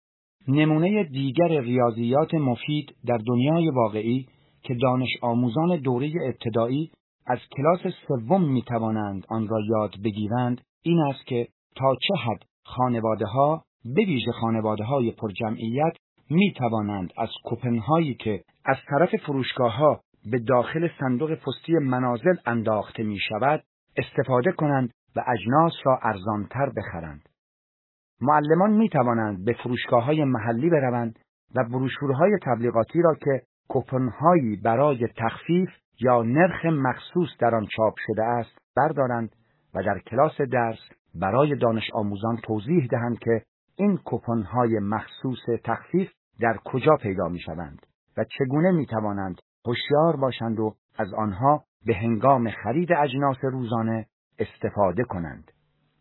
نمونه دیگر ریاضیات مفید در دنیای واقعی که دانش آموزان دوره ابتدایی از کلاس سوم می توانند آن را یاد بگیرند این است که تا چه حد خانواده‌ها، به ویژه خانواده‌های پرجمعیت، می توانند از کوپن‌هایی که از طرف فروشگاه‌ها به داخل صندوق پستی منازل انداخته می شود استفاده کنند و اجناس را ارزانتر بخرند. معلمان می توانند به فروشگاه‌های محلی بروند و بروشورهای تبلیغاتی را که کوپن‌هایی برای تخفیف یا نرخ مخصوص در آن چاپ شده است بردارند و در کلاس درس برای دانش آموزان توضیح دهند که این کوپن‌های مخصوص تخفیف در کجا پیدا می‌شوند و چگونه می‌توانند هوشیار باشند و از آنها به هنگام خرید اجناس روزانه استفاده کنند.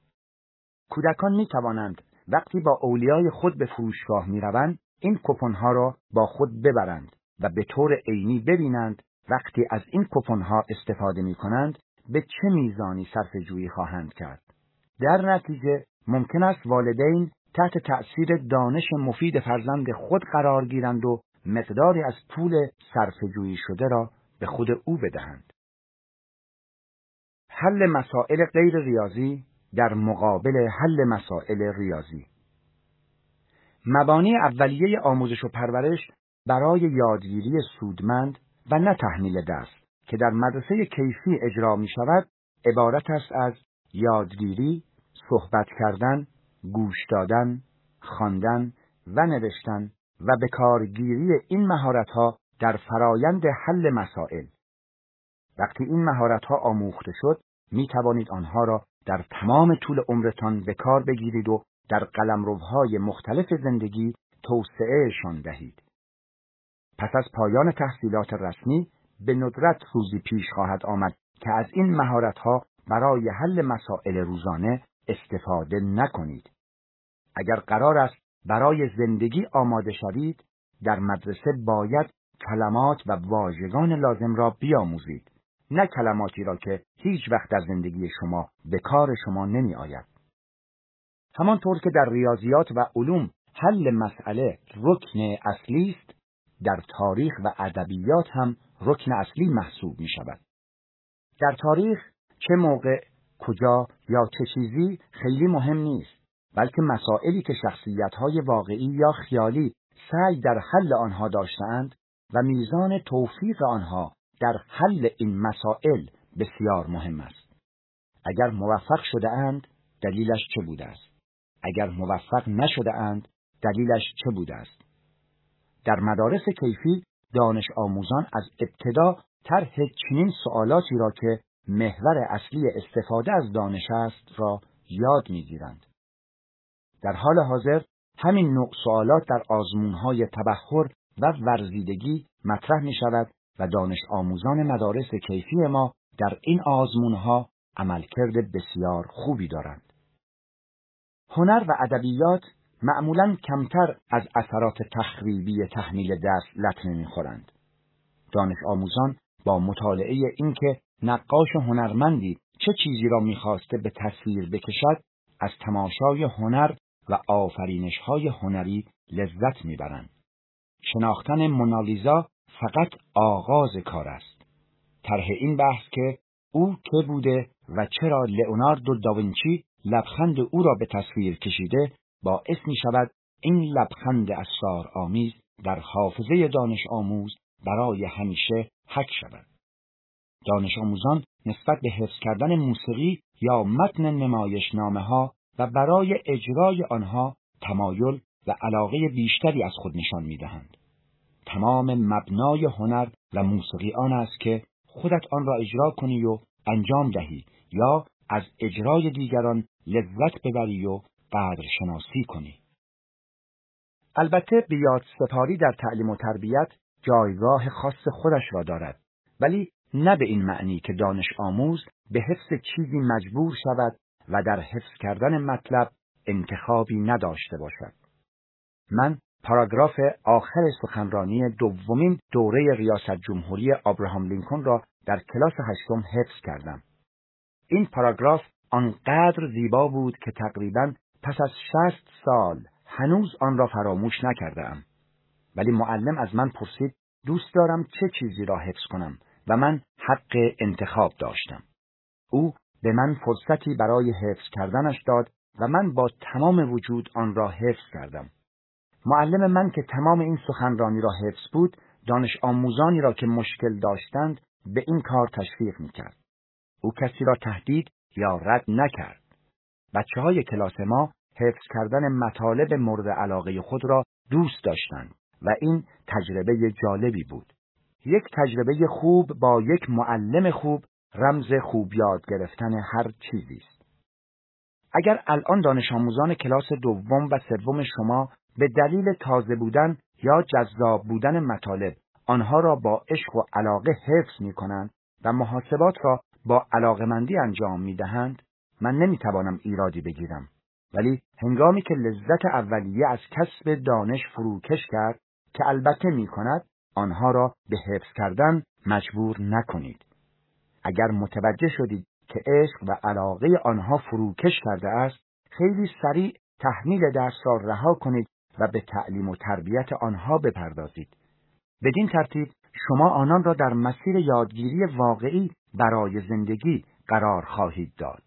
کودکان می‌توانند وقتی با اولیای خود به فروشگاه می‌روند این کوپن‌ها را با خود ببرند و به طور عینی ببینند وقتی از این کوپن‌ها استفاده می‌کنند به چه میزانی صرفه‌جویی خواهند کرد. در نتیجه ممکن است والدین تحت تأثیر دانش مفید فرزند خود قرار گیرند و مقداری از پول صرفه‌جویی شده را به خود او بدهند. حل مسائل غیر ریاضی در مقابل حل مسائل ریاضی. مبانی اولیه آموزش و پرورش برای یادگیری سودمند و نه تحمیل درس که در مدرسه کیفی اجرا می شود عبارت است از یادگیری، صحبت کردن، گوش دادن، خواندن و نوشتن و به کارگیری این مهارت‌ها در فرایند حل مسائل. وقتی این مهارت‌ها آموخته شد، می توانید آنها را در تمام طول عمرتان به کار بگیرید و در قلمروهای مختلف زندگی توسعهشان دهید. پس از پایان تحصیلات رسمی به ندرت روزی پیش خواهد آمد که از این مهارت‌ها برای حل مسائل روزانه استفاده نکنید. اگر قرار است برای زندگی آماده شوید، در مدرسه باید کلمات و واژگان لازم را بیاموزید، نه کلماتی را که هیچ وقت در زندگی شما به کار شما نمی آید. همانطور که در ریاضیات و علوم حل مسئله رکن اصلی است، در تاریخ و ادبیات هم رکن اصلی محسوب می شود. در تاریخ چه موقع، کجا یا چه چیزی خیلی مهم نیست، بلکه مسائلی که شخصیت‌های واقعی یا خیالی سعی در حل آنها داشتند و میزان توفیق آنها در حل این مسائل بسیار مهم است. اگر موفق شده اند، دلیلش چه بوده است؟ اگر موفق نشده اند، دلیلش چه بوده است؟ در مدارس کیفی دانش آموزان از ابتدا طرح چنین سوالاتی را که محور اصلی استفاده از دانش است را یاد می‌گیرند. در حال حاضر همین نوع سوالات در آزمون‌های تبحر و ورزیدگی مطرح می‌شود و دانش آموزان مدارس کیفی ما در این آزمون‌ها عملکرد بسیار خوبی دارند. هنر و ادبیات معمولاً کمتر از اثرات تخریبی تحمیل دست لطمه می‌خورند. دانش آموزان با مطالعه اینکه نقاش هنرمندی چه چیزی را می‌خواسته به تصویر بکشد، از تماشای هنر و آفرینش‌های هنری لذت می‌برند. شناختن مونالیزا فقط آغاز کار است. طرح این بحث که او که بوده و چرا لئوناردو داوینچی لبخند او را به تصویر کشیده، باعث می‌شود این لبخند اسرارآمیز در حافظه دانش آموز برای همیشه حک شود. دانش آموزان نسبت به حفظ کردن موسیقی یا متن نمایشنامه‌ها و برای اجرای آنها تمایل و علاقه بیشتری از خود نشان می‌دهند. تمام مبنای هنر و موسیقی آن است که خودت آن را اجرا کنی و انجام دهی یا از اجرای دیگران لذت ببری و قدر شناسی کنی. البته بیاد سپاری در تعلیم و تربیت جایگاه خاص خودش را دارد، ولی نه به این معنی که دانش آموز به حفظ چیزی مجبور شود و در حفظ کردن مطلب انتخابی نداشته باشد. من پاراگراف آخر سخنرانی دومین دوره ریاست جمهوری ابراهام لینکن را در کلاس هشتم حفظ کردم. این پاراگراف آنقدر زیبا بود که تقریباً پس از شصت سال هنوز آن را فراموش نکردم. ولی معلم از من پرسید دوست دارم چه چیزی را حفظ کنم و من حق انتخاب داشتم. او به من فرصتی برای حفظ کردنش داد و من با تمام وجود آن را حفظ کردم. معلم من که تمام این سخنرانی را حفظ بود، دانش آموزانی را که مشکل داشتند به این کار تشویق می‌کرد. او کسی را تهدید یا رد نکرد. بچه‌های کلاس ما حفظ کردن مطالب مورد علاقه خود را دوست داشتند و این تجربه جالبی بود. یک تجربه خوب با یک معلم خوب رمز خوب یاد گرفتن هر چیزی است. اگر الان دانش آموزان کلاس دوم و سوم شما به دلیل تازه بودن یا جذاب بودن مطالب آنها را با عشق و علاقه حفظ می کنند و محاسبات را با علاقمندی انجام می دهند، من نمی توانم ایرادی بگیرم. ولی هنگامی که لذت اولیه از کسب دانش فروکش کرد که البته می کند، آنها را به حفظ کردن مجبور نکنید. اگر متوجه شدید که عشق و علاقه آنها فروکش کرده است، خیلی سریع تحمیل درس را رها کنید و به تعلیم و تربیت آنها بپردازید. بدین ترتیب شما آنان را در مسیر یادگیری واقعی برای زندگی قرار خواهید داد.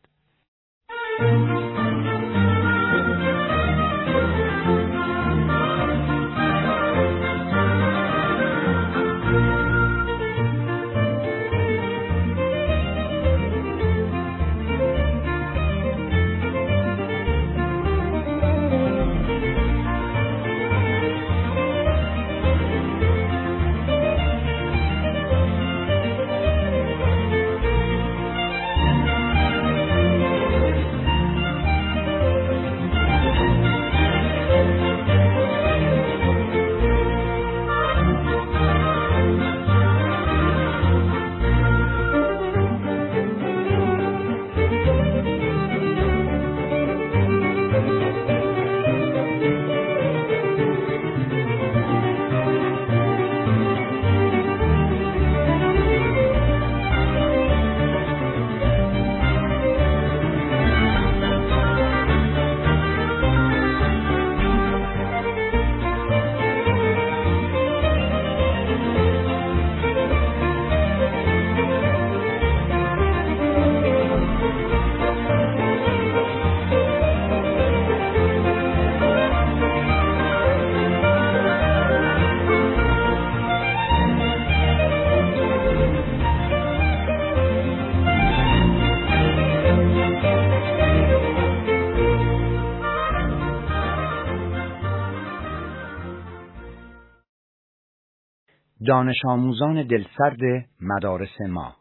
دانش آموزان دلسرد مدارس ما.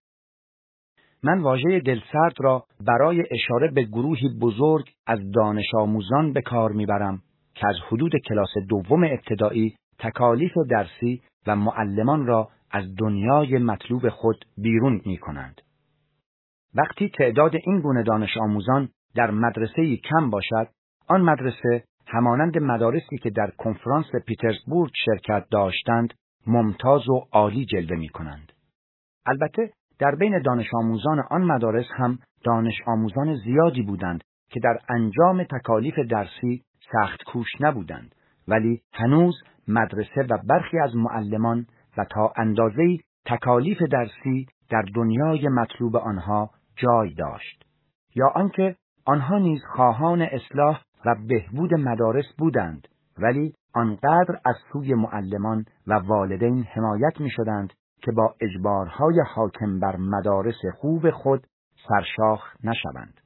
من واژه دلسرد را برای اشاره به گروهی بزرگ از دانش آموزان به کار میبرم که از حدود کلاس دوم ابتدایی تکالیف درسی و معلمان را از دنیای مطلوب خود بیرون می کنند. وقتی تعداد این گونه دانش آموزان در مدرسه‌ای کم باشد، آن مدرسه همانند مدارسی که در کنفرانس پیترزبورگ شرکت داشتند، ممتاز و عالی جلوه می کنند. البته در بین دانش آموزان آن مدارس هم دانش آموزان زیادی بودند که در انجام تکالیف درسی سخت کوش نبودند، ولی هنوز مدرسه و برخی از معلمان و تا اندازه‌ای تکالیف درسی در دنیای مطلوب آنها جای داشت، یا آنکه آنها نیز خواهان اصلاح و بهبود مدارس بودند، ولی آنقدر از سوی معلمان و والدین حمایت می شدند که با اجبارهای حاکم بر مدارس خوب خود سرشاخ نشوند.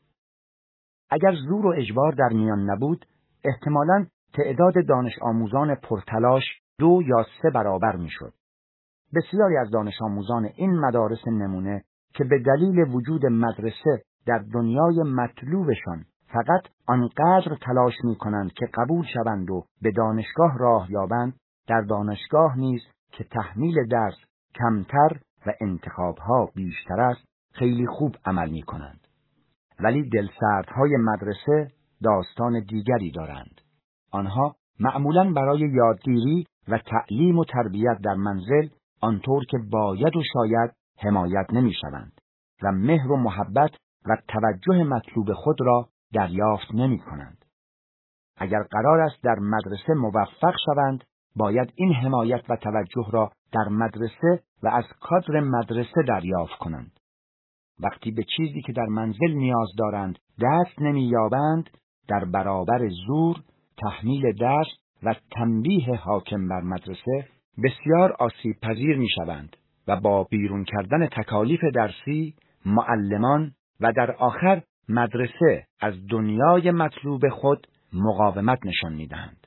اگر زور و اجبار در میان نبود، احتمالاً تعداد دانش آموزان پرتلاش دو یا سه برابر می شد. بسیاری از دانش آموزان این مدارس نمونه که به دلیل وجود مدرسه در دنیای مطلوبشان فقط آنقدر تلاش می کنند که قبول شوند و به دانشگاه راه یابند، در دانشگاه نیز که تحمیل درس کمتر و انتخابها بیشتر است، خیلی خوب عمل می کنند. ولی دلسردهای مدرسه داستان دیگری دارند. آنها معمولاً برای یادگیری و تعلیم و تربیت در منزل آنطور که باید و شاید حمایت نمی شوند و مهر و محبت و توجه مطلوب خود را دریافت نمی کنند. اگر قرار است در مدرسه موفق شوند، باید این حمایت و توجه را در مدرسه و از کادر مدرسه دریافت کنند. وقتی به چیزی که در منزل نیاز دارند دست نمی یابند، در برابر زور، تحمیل درس و تنبیه حاکم بر مدرسه بسیار آسیب پذیر می شوند و با بیرون کردن تکالیف درسی، معلمان و در آخر مدرسه از دنیای مطلوب خود مقاومت نشان می دهند.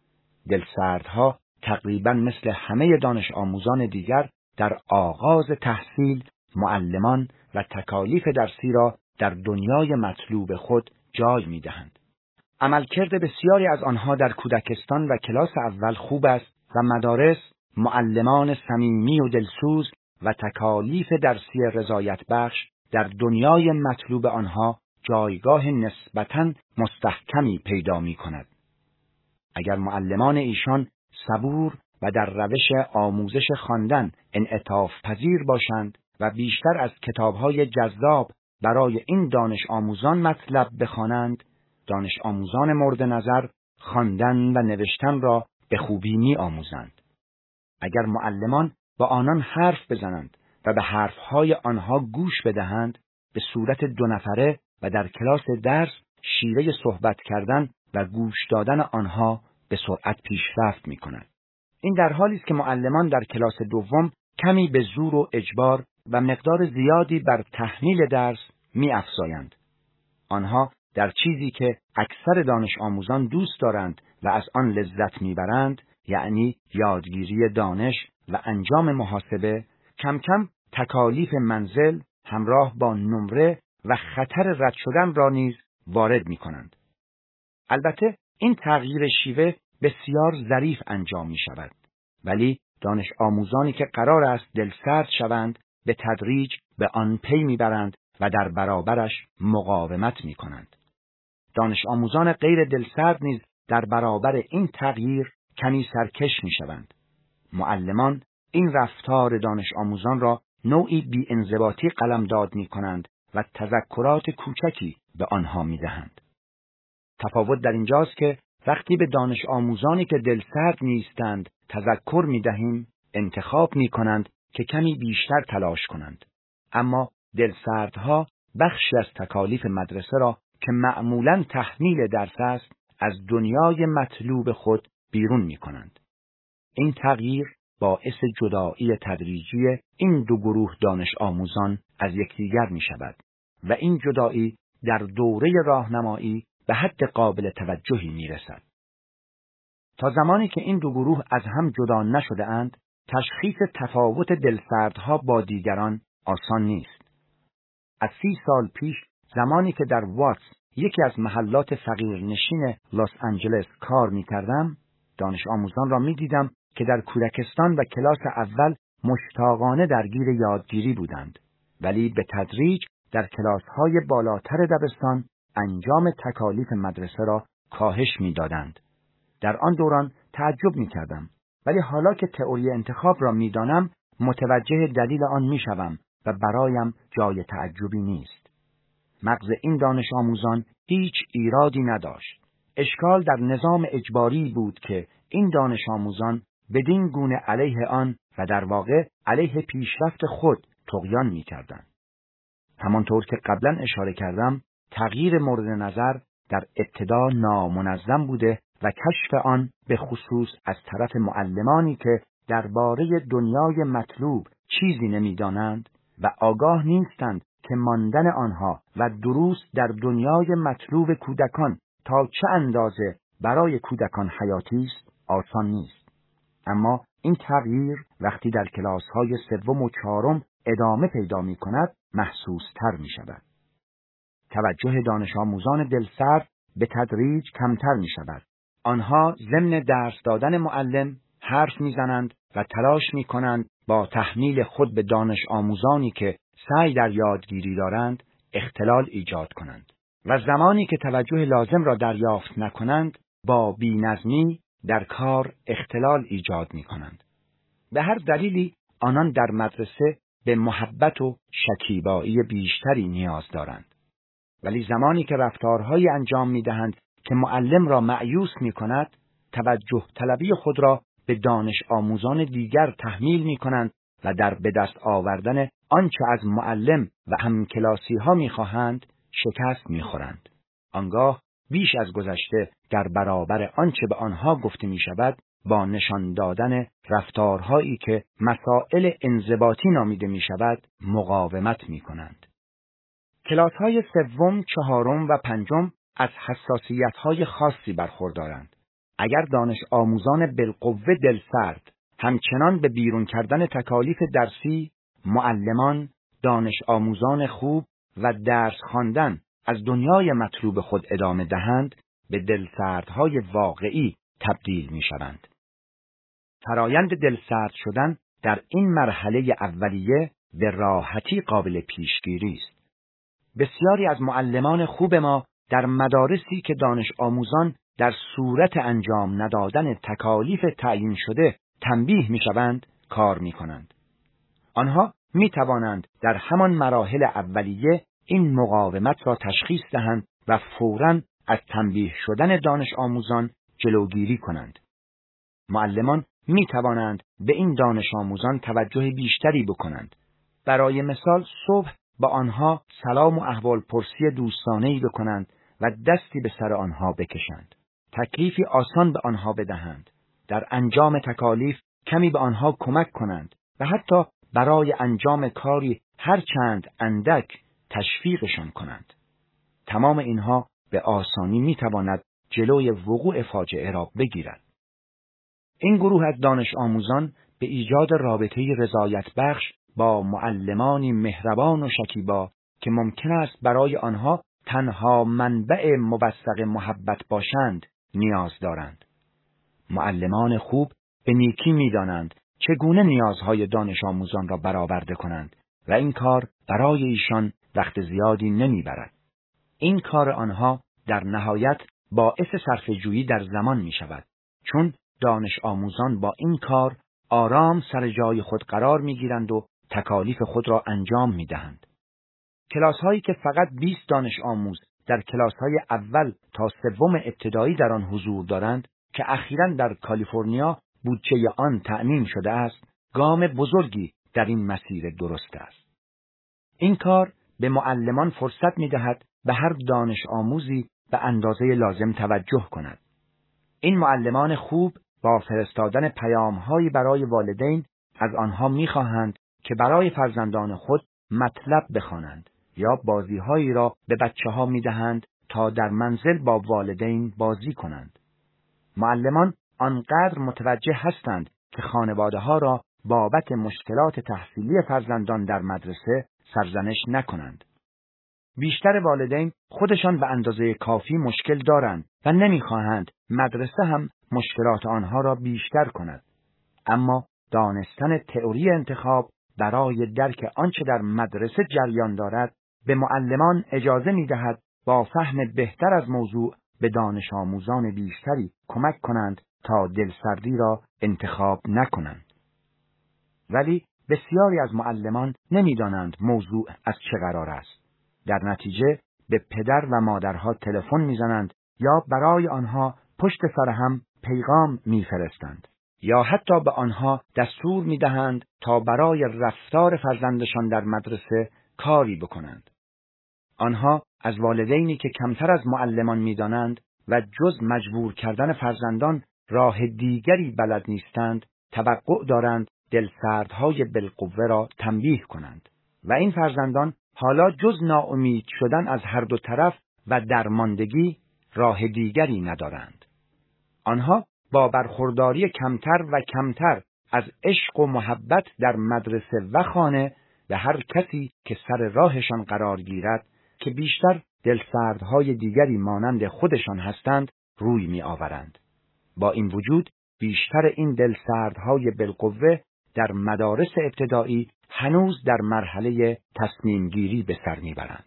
دلسردها تقریبا مثل همه دانش آموزان دیگر در آغاز تحصیل معلمان و تکالیف درسی را در دنیای مطلوب خود جای می دهند. عملکرد بسیاری از آنها در کودکستان و کلاس اول خوب است و مدارس معلمان صمیمی و دلسوز و تکالیف درسی رضایت بخش در دنیای مطلوب آنها جایگاه نسبتاً مستحکمی پیدا می کند. اگر معلمان ایشان صبور و در روش آموزش خواندن انعطاف پذیر باشند و بیشتر از کتاب‌های جذاب برای این دانش آموزان مطلب بخوانند، دانش آموزان مورد نظر خواندن و نوشتن را به خوبی می آموزند. اگر معلمان با آنان حرف بزنند و به حرفهای آنها گوش بدهند، به صورت دو نفره و در کلاس درس شیوه صحبت کردن و گوش دادن آنها به سرعت پیشرفت می کند. این در حالی است که معلمان در کلاس دوم کمی به زور و اجبار و مقدار زیادی بر تحمیل درس می افزایند. آنها در چیزی که اکثر دانش آموزان دوست دارند و از آن لذت میبرند، یعنی یادگیری دانش و انجام محاسبه، کم کم تکالیف منزل همراه با نمره و خطر رد شدن را نیز وارد می کنند. البته این تغییر شیوه بسیار ظریف انجام می شود، ولی دانش آموزانی که قرار است دلسرد شوند به تدریج به آن پی می برند و در برابرش مقاومت می کنند. دانش آموزان غیر دلسرد نیز در برابر این تغییر کمی سرکش می شوند. معلمان این رفتار دانش آموزان را نوعی بی انضباطی قلمداد می کنند و تذکرات کوچکی به آنها می دهند. تفاوت در اینجاست که وقتی به دانش آموزانی که دلسرد نیستند تذکر می دهیم، انتخاب می کنند که کمی بیشتر تلاش کنند. اما دلسردها بخشی از تکالیف مدرسه را که معمولاً تحمیل درس است از دنیای مطلوب خود بیرون می کنند. این تغییر باعث جدایی تدریجی این دو گروه دانش آموزان از یکدیگر می شود و این جدایی در دوره راهنمایی به حد قابل توجهی می رسد. تا زمانی که این دو گروه از هم جدا نشده اند، تشخیص تفاوت دلسردها با دیگران آسان نیست. از سی سال پیش زمانی که در واتس یکی از محلات فقیرنشین لس آنجلس کار می کردم، دانش آموزان را می دیدم که در کودکستان و کلاس اول مشتاقانه درگیر یادگیری بودند، ولی به تدریج در کلاس‌های بالاتر دبستان انجام تکالیف مدرسه را کاهش می دادند. در آن دوران تعجب می کردم، ولی حالا که تئوری انتخاب را می دانم متوجه دلیل آن می شوم و برایم جای تعجبی نیست. مغز این دانش آموزان هیچ ایرادی نداشت. اشکال در نظام اجباری بود که این دانش آموزان بدین گونه علیه آن و در واقع علیه پیشرفت خود طغیان می کردند. همانطور که قبلا اشاره کردم، تغییر مورد نظر در ابتدا نامنظم بوده و کشف آن به خصوص از طرف معلمانی که درباره دنیای مطلوب چیزی نمی‌دانند و آگاه نیستند که ماندن آنها و دروس در دنیای مطلوب کودکان تا چه اندازه برای کودکان حیاتی است، آسان نیست. اما این تغییر وقتی در کلاس‌های سوم و چهارم ادامه پیدا می‌کند محسوس‌تر می‌شود. توجه دانش آموزان دلسرد به تدریج کمتر می‌شود. آنها ضمن درس دادن معلم حرف می‌زنند و تلاش می‌کنند با تحمیل خود به دانش آموزانی که سعی در یادگیری دارند اختلال ایجاد کنند و زمانی که توجه لازم را دریافت نکنند با بی‌نظمی در کار اختلال ایجاد می‌کنند. به هر دلیلی آنان در مدرسه به محبت و شکیبایی بیشتری نیاز دارند. ولی زمانی که رفتارهایی انجام می‌دهند که معلم را مأیوس می‌کند، توجه طلبی خود را به دانش آموزان دیگر تحمیل می‌کنند و در به دست آوردن آنچه از معلم و همکلاسی‌ها می‌خواهند شکست می‌خورند. آنگاه بیش از گذشته در برابر آنچه به آنها گفته می‌شود با نشان دادن رفتارهایی که مسائل انضباطی نامیده می‌شود مقاومت می‌کنند. کلاس‌های سوم، چهارم و پنجم از حساسیت‌های خاصی برخوردارند. اگر دانش آموزان بالقوه دلسرد همچنان به بیرون کردن تکالیف درسی، معلمان، دانش آموزان خوب و درس خواندن از دنیای مطلوب خود ادامه دهند، به دلسردهای واقعی تبدیل می‌شوند. فرایند دلسرد شدن در این مرحله اولیه به راحتی قابل پیشگیری است. بسیاری از معلمان خوب ما در مدارسی که دانش آموزان در صورت انجام ندادن تکالیف تعیین شده تنبیه می‌شوند کار می‌کنند. آنها می‌توانند در همان مراحل اولیه این مقاومت را تشخیص دهند و فوراً از تنبیه شدن دانش آموزان جلوگیری کنند. معلمان می‌توانند به این دانش آموزان توجه بیشتری بکنند. برای مثال صبح با آنها سلام و احوالپرسی دوستانه‌ای بکنند و دستی به سر آنها بکشند. تکلیفی آسان به آنها بدهند. در انجام تکالیف کمی به آنها کمک کنند و حتی برای انجام کاری هر چند اندک تشویقشان کنند. تمام اینها به آسانی میتواند جلوی وقوع فاجعه را بگیرد. این گروه از دانش آموزان به ایجاد رابطه‌ای رضایت بخش با معلمانی مهربان و شکیبا که ممکن است برای آنها تنها منبع موثق محبت باشند نیاز دارند. معلمان خوب به نیکی می‌دانند چگونه نیازهای دانش آموزان را برآورده کنند و این کار برای ایشان وقت زیادی نمیبرد. این کار آنها در نهایت باعث صرفه‌جویی در زمان می‌شود، چون دانش آموزان با این کار آرام سر جای خود قرار می‌گیرند و تکالیف خود را انجام می‌دهند. کلاس‌هایی که فقط بیست دانش آموز در کلاس‌های اول تا سوم ابتدایی در آن حضور دارند که اخیراً در کالیفرنیا بودجه آن تأمین شده است، گام بزرگی در این مسیر درست است. این کار به معلمان فرصت می‌دهد به هر دانش آموزی به اندازه لازم توجه کند. این معلمان خوب با فرستادن پیام‌هایی برای والدین از آنها می‌خواهند که برای فرزندان خود مطلب بخوانند یا بازی‌هایی را به بچه‌ها می‌دهند تا در منزل با والدین بازی کنند. معلمان آنقدر متوجه هستند که خانواده‌ها را بابت مشکلات تحصیلی فرزندان در مدرسه سرزنش نکنند. بیشتر والدین خودشان به اندازه کافی مشکل دارند و نمیخواهند مدرسه هم مشکلات آنها را بیشتر کند. اما دانستن تئوری انتخاب برای درک آنچه در مدرسه جریان دارد به معلمان اجازه می‌دهد با فهم بهتر از موضوع به دانش آموزان بیشتری کمک کنند تا دلسردی را انتخاب نکنند. ولی بسیاری از معلمان نمی‌دانند موضوع از چه قرار است. در نتیجه به پدر و مادرها تلفن می‌زنند یا برای آنها پشت سر هم پیغام می‌فرستند یا حتی به آنها دستور می‌دهند تا برای رفتار فرزندشان در مدرسه کاری بکنند. آنها از والدینی که کمتر از معلمان می‌دانند و جز مجبور کردن فرزندان راه دیگری بلد نیستند، توقع دارند دلسردهای بالقوه را تنبیه کنند و این فرزندان حالا جز ناامید شدن از هر دو طرف و درماندگی راه دیگری ندارند. آنها با برخورداری کمتر و کمتر از عشق و محبت در مدرسه و خانه به هر کسی که سر راهشان قرار گیرد که بیشتر دلسردهای دیگری مانند خودشان هستند روی می آورند. با این وجود بیشتر این دلسردهای بالقوه در مدارس ابتدایی هنوز در مرحله تصمیم گیری به سر می برند.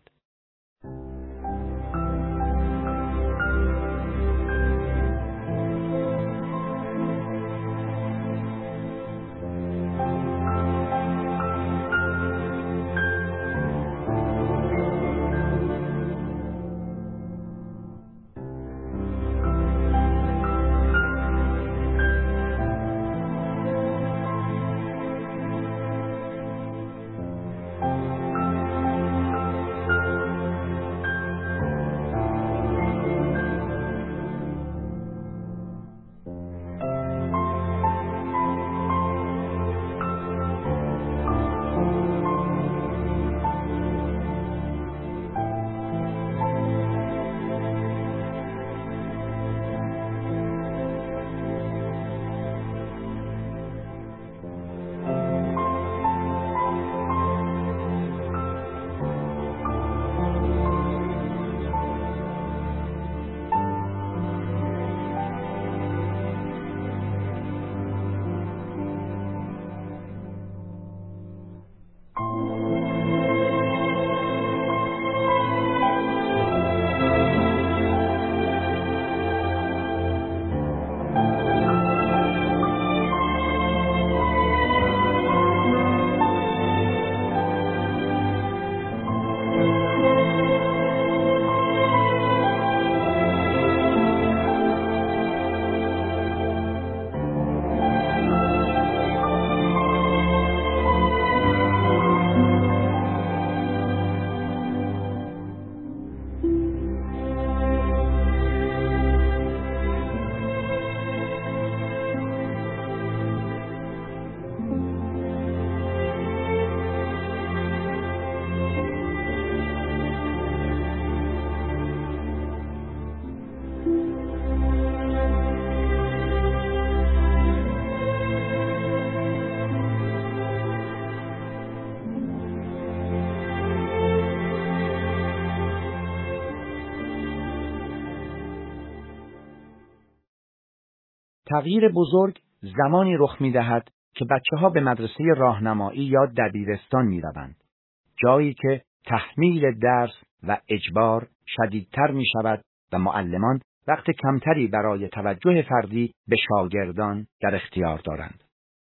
تغییر بزرگ زمانی رخ می‌دهد که بچه‌ها به مدرسه راهنمایی یا دبیرستان می‌روند، جایی که تحمیل درس و اجبار شدیدتر می‌شود و معلمان وقت کمتری برای توجه فردی به شاگردان در اختیار دارند.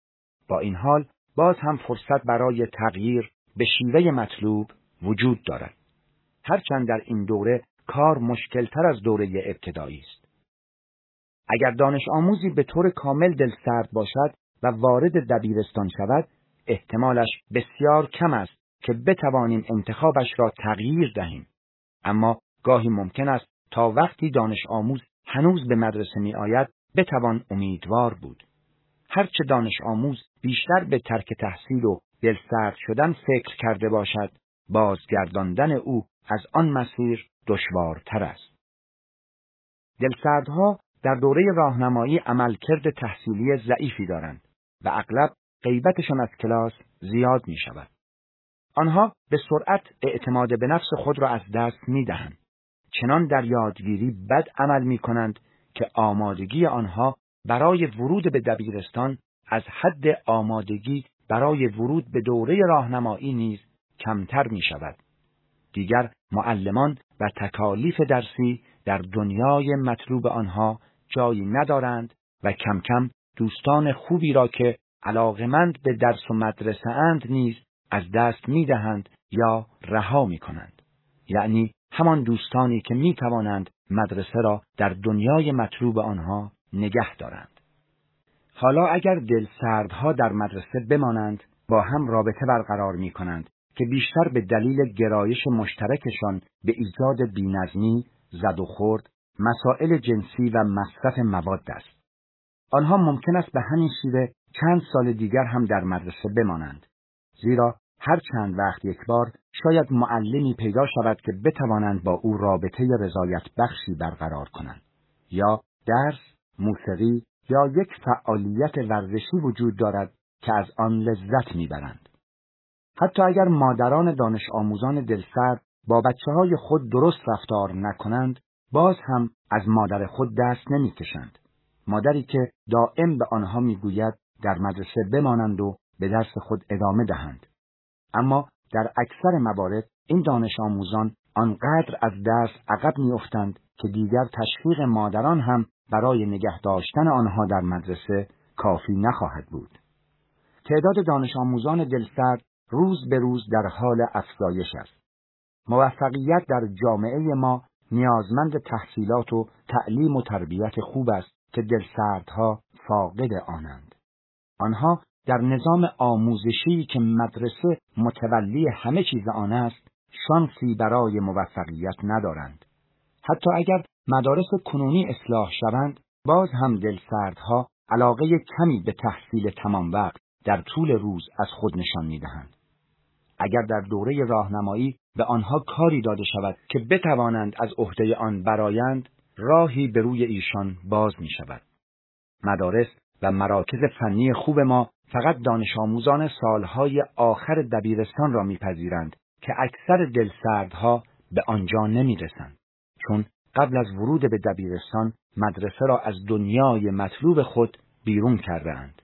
با این حال باز هم فرصت برای تغییر به شیوه مطلوب وجود دارد، هرچند در این دوره کار مشکل‌تر از دوره ابتدایی است. اگر دانش آموزی به طور کامل دلسرد باشد و وارد دبیرستان شود، احتمالش بسیار کم است که بتوانیم انتخابش را تغییر دهیم. اما گاهی ممکن است تا وقتی دانش آموز هنوز به مدرسه می آید بتوان امیدوار بود. هرچه دانش آموز بیشتر به ترک تحصیل و دلسرد شدن فکر کرده باشد، بازگرداندن او از آن مسیر دشوارتر است. دلسردها در دوره راهنمایی عملکرد تحصیلی ضعیفی دارند و اغلب غیبتشان از کلاس زیاد می شود. آنها به سرعت اعتماد به نفس خود را از دست می دهند. چنان در یادگیری بد عمل می کنند که آمادگی آنها برای ورود به دبیرستان از حد آمادگی برای ورود به دوره راهنمایی نیز کمتر می شود. دیگر معلمان و تکالیف درسی در دنیای مطلوب آنها جایی ندارند و کم کم دوستان خوبی را که علاقمند به درس و مدرسه اند نیز از دست می دهند یا رها می کنند. یعنی همان دوستانی که می توانند مدرسه را در دنیای مطلوب آنها نگه دارند. حالا اگر دلسردها در مدرسه بمانند، با هم رابطه برقرار می کنند که بیشتر به دلیل گرایش مشترکشان به ایجاد بی‌نظمی، زد و خورد، مسائل جنسی و مصرف مواد است. آنها ممکن است به همین شیوه چند سال دیگر هم در مدرسه بمانند. زیرا هر چند وقت یک بار شاید معلمی پیدا شود که بتوانند با او رابطه رضایت بخشی برقرار کنند. یا درس، موسیقی یا یک فعالیت ورزشی وجود دارد که از آن لذت میبرند. حتی اگر مادران دانش آموزان دلسرد با بچه‌های خود درست رفتار نکنند، باز هم از مادر خود دست نمیکشند. مادری که دائم به آنها میگوید در مدرسه بمانند و به درس خود ادامه دهند. اما در اکثر موارد این دانش آموزان آنقدر از درس عقب میافتند که دیگر تشویق مادران هم برای نگه داشتن آنها در مدرسه کافی نخواهد بود. تعداد دانش آموزان دلسرد روز به روز در حال افزایش است. موفقیت در جامعه ما نیازمند تحصیلات و تعلیم و تربیت خوب است که دلسردها فاقد آنند. آنها در نظام آموزشی که مدرسه متولی همه چیز آن است، شانسی برای موفقیت ندارند. حتی اگر مدارس کنونی اصلاح شوند، باز هم دلسردها علاقه کمی به تحصیل تمام وقت در طول روز از خود نشان می‌دهند. اگر در دوره راهنمایی به آنها کاری داده شود که بتوانند از عهده آن برآیند، راهی به روی ایشان باز می شود. مدارس و مراکز فنی خوب ما فقط دانش آموزان سالهای آخر دبیرستان را میپذیرند که اکثر دلسردها به آنجا نمی رسند. چون قبل از ورود به دبیرستان مدرسه را از دنیای مطلوب خود بیرون کرده اند.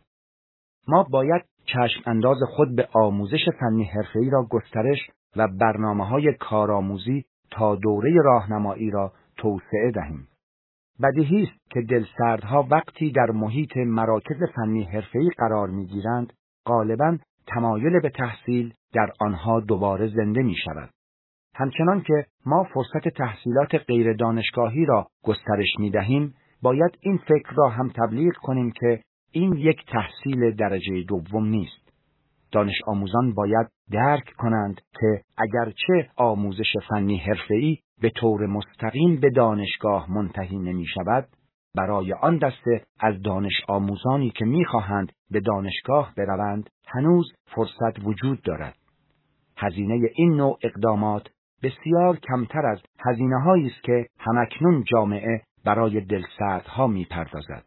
ما باید چشم انداز خود به آموزش فنی حرفه‌ای را گسترش و برنامه‌های کارآموزی تا دوره راهنمایی را توسعه دهیم. بدیهی است که دلسردها وقتی در محیط مراکز فنی حرفه‌ای قرار می‌گیرند، غالباً تمایل به تحصیل در آنها دوباره زنده می‌شود. همچنان که ما فرصت تحصیلات غیر دانشگاهی را گسترش می‌دهیم، باید این فکر را هم تبلیغ کنیم که این یک تحصیل درجه دوم نیست. دانش آموزان باید درک کنند که اگرچه آموزش فنی حرفه‌ای به طور مستقیم به دانشگاه منتهی نمی شود، برای آن دسته از دانش آموزانی که می خواهند به دانشگاه بروند هنوز فرصت وجود دارد. هزینه این نوع اقدامات بسیار کمتر از هزینه هایی است که همکنون جامعه برای دلسردها می پردازد.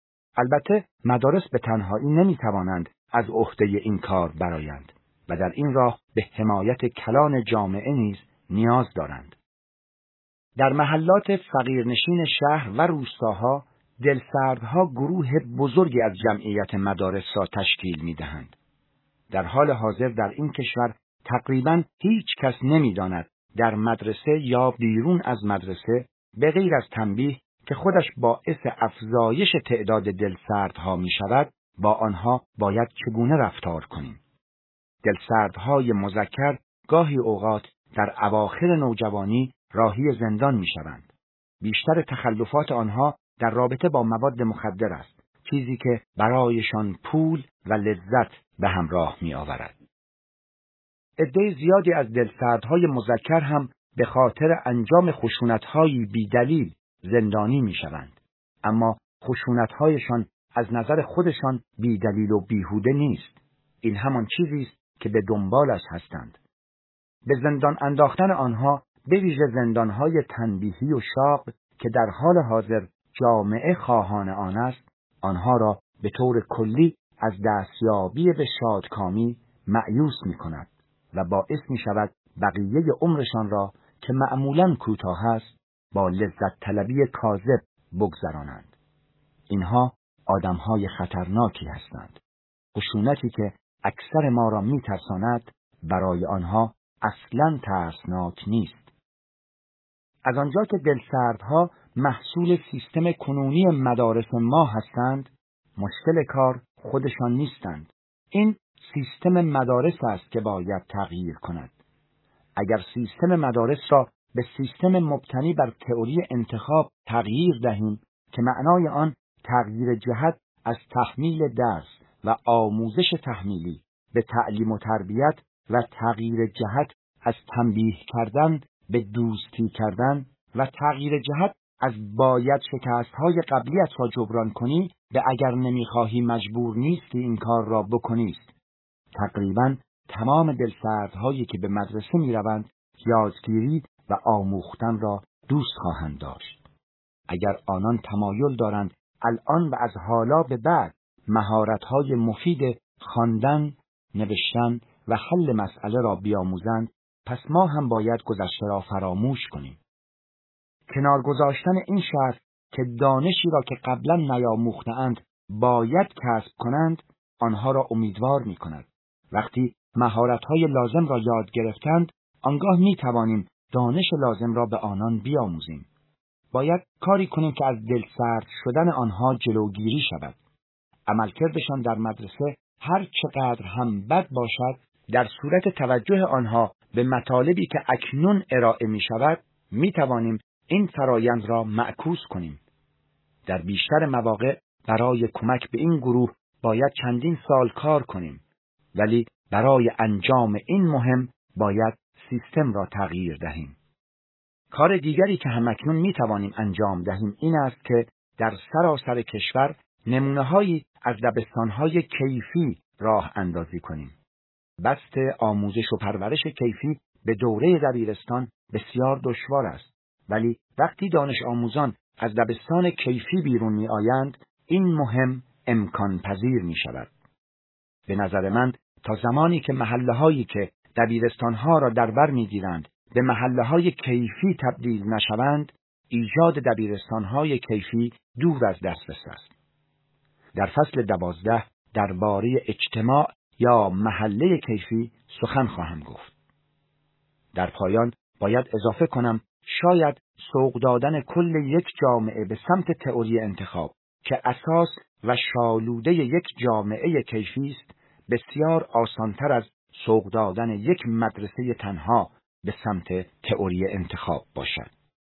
البته مدارس به تنهایی نمی توانند از عهده این کار برآیند و در این راه به حمایت کلان جامعه نیز نیاز دارند. در محلات فقیرنشین شهر و روستاها دلسردها گروه بزرگی از جمعیت مدارس را تشکیل می دهند. در حال حاضر در این کشور تقریباً هیچ کس نمی داند در مدرسه یا بیرون از مدرسه به غیر از تنبیه که خودش باعث افزایش تعداد دلسردها می شود، با آنها باید چگونه رفتار کنیم. دلسردهای مذکر گاهی اوقات در اواخر نوجوانی راهی زندان می شوند. بیشتر تخلفات آنها در رابطه با مواد مخدر است، چیزی که برایشان پول و لذت به همراه می آورد. عده زیادی از دلسردهای مذکر هم به خاطر انجام خشونت‌های بی‌دلیل زندانی می شوند. اما خشونت‌هایشان از نظر خودشان بی‌دلیل و بیهوده نیست. این همان چیزی است که به دنبالش هستند. به زندان انداختن آنها، به ویژه زندان‌های تنبیهی و شاق که در حال حاضر جامعه خواهان آن است، آنها را به طور کلی از دستیابی به شادکامی مأیوس می کند و باعث می شود بقیه عمرشان را که معمولاً کوتاه است با لذت طلبی کاذب بگذرانند. اینها آدمهای خطرناکی هستند. خشونتی که اکثر ما را می ترساند برای آنها اصلاً ترسناک نیست. از آنجا که دلسردها محصول سیستم کنونی مدارس ما هستند، مشکل کار خودشان نیستند. این سیستم مدارس است که باید تغییر کند. اگر سیستم مدارس را به سیستم مبتنی بر تئوری انتخاب تغییر دهیم که معنای آن تغییر جهت از تحمیل درس و آموزش تحمیلی به تعلیم و تربیت و تغییر جهت از تنبیه کردن به دوستی کردن و تغییر جهت از باید شکست‌های قبلیت را جبران کنی به اگر نمیخواهی مجبور نیستی این کار را بکنیست. تقریباً تمام دلسردهایی که به مدرسه میروند یادگیری و آموختن را دوست خواهند داشت. اگر آنان تمایل دارند الان و از حالا به بعد مهارت‌های مفید خواندن، نوشتن و حل مسئله را بیاموزند، پس ما هم باید گذشته را فراموش کنیم. کنار گذاشتن این شرط که دانشی را که قبلا نیاموخته‌اند باید کسب کنند، آنها را امیدوار می کند. وقتی مهارت‌های لازم را یاد گرفتند، آنگاه می توانیم دانش لازم را به آنان بیاموزیم. باید کاری کنیم که از دلسرد شدن آنها جلوگیری شود. عملکردشان در مدرسه هر چقدر هم بد باشد، در صورت توجه آنها به مطالبی که اکنون ارائه می شود، می توانیم این فرایند را معکوس کنیم. در بیشتر مواقع برای کمک به این گروه باید چندین سال کار کنیم، ولی برای انجام این مهم باید سیستم را تغییر دهیم. کار دیگری که همکنون می توانیم انجام دهیم این است که در سراسر کشور نمونه‌هایی از دبستان‌های کیفی راه اندازی کنیم. بست آموزش و پرورش کیفی به دوره دبیرستان بسیار دشوار است، ولی وقتی دانش آموزان از دبستان کیفی بیرون می آیند، این مهم امکان پذیر می شود. به نظر من تا زمانی که محله‌هایی که دبیرستان‌ها را در بر می‌گیرند به محله‌های کیفی تبدیل نشوند، ایجاد دبیرستان‌های کیفی دور از دسترس است. در فصل دوازده درباره اجتماع یا محله کیفی سخن خواهم گفت. در پایان باید اضافه کنم شاید سوق دادن کل یک جامعه به سمت تئوری انتخاب که اساس و شالوده یک جامعه کیفی است بسیار آسانتر از سوق دادن یک مدرسه تنها به سمت تئوری انتخاب باشد.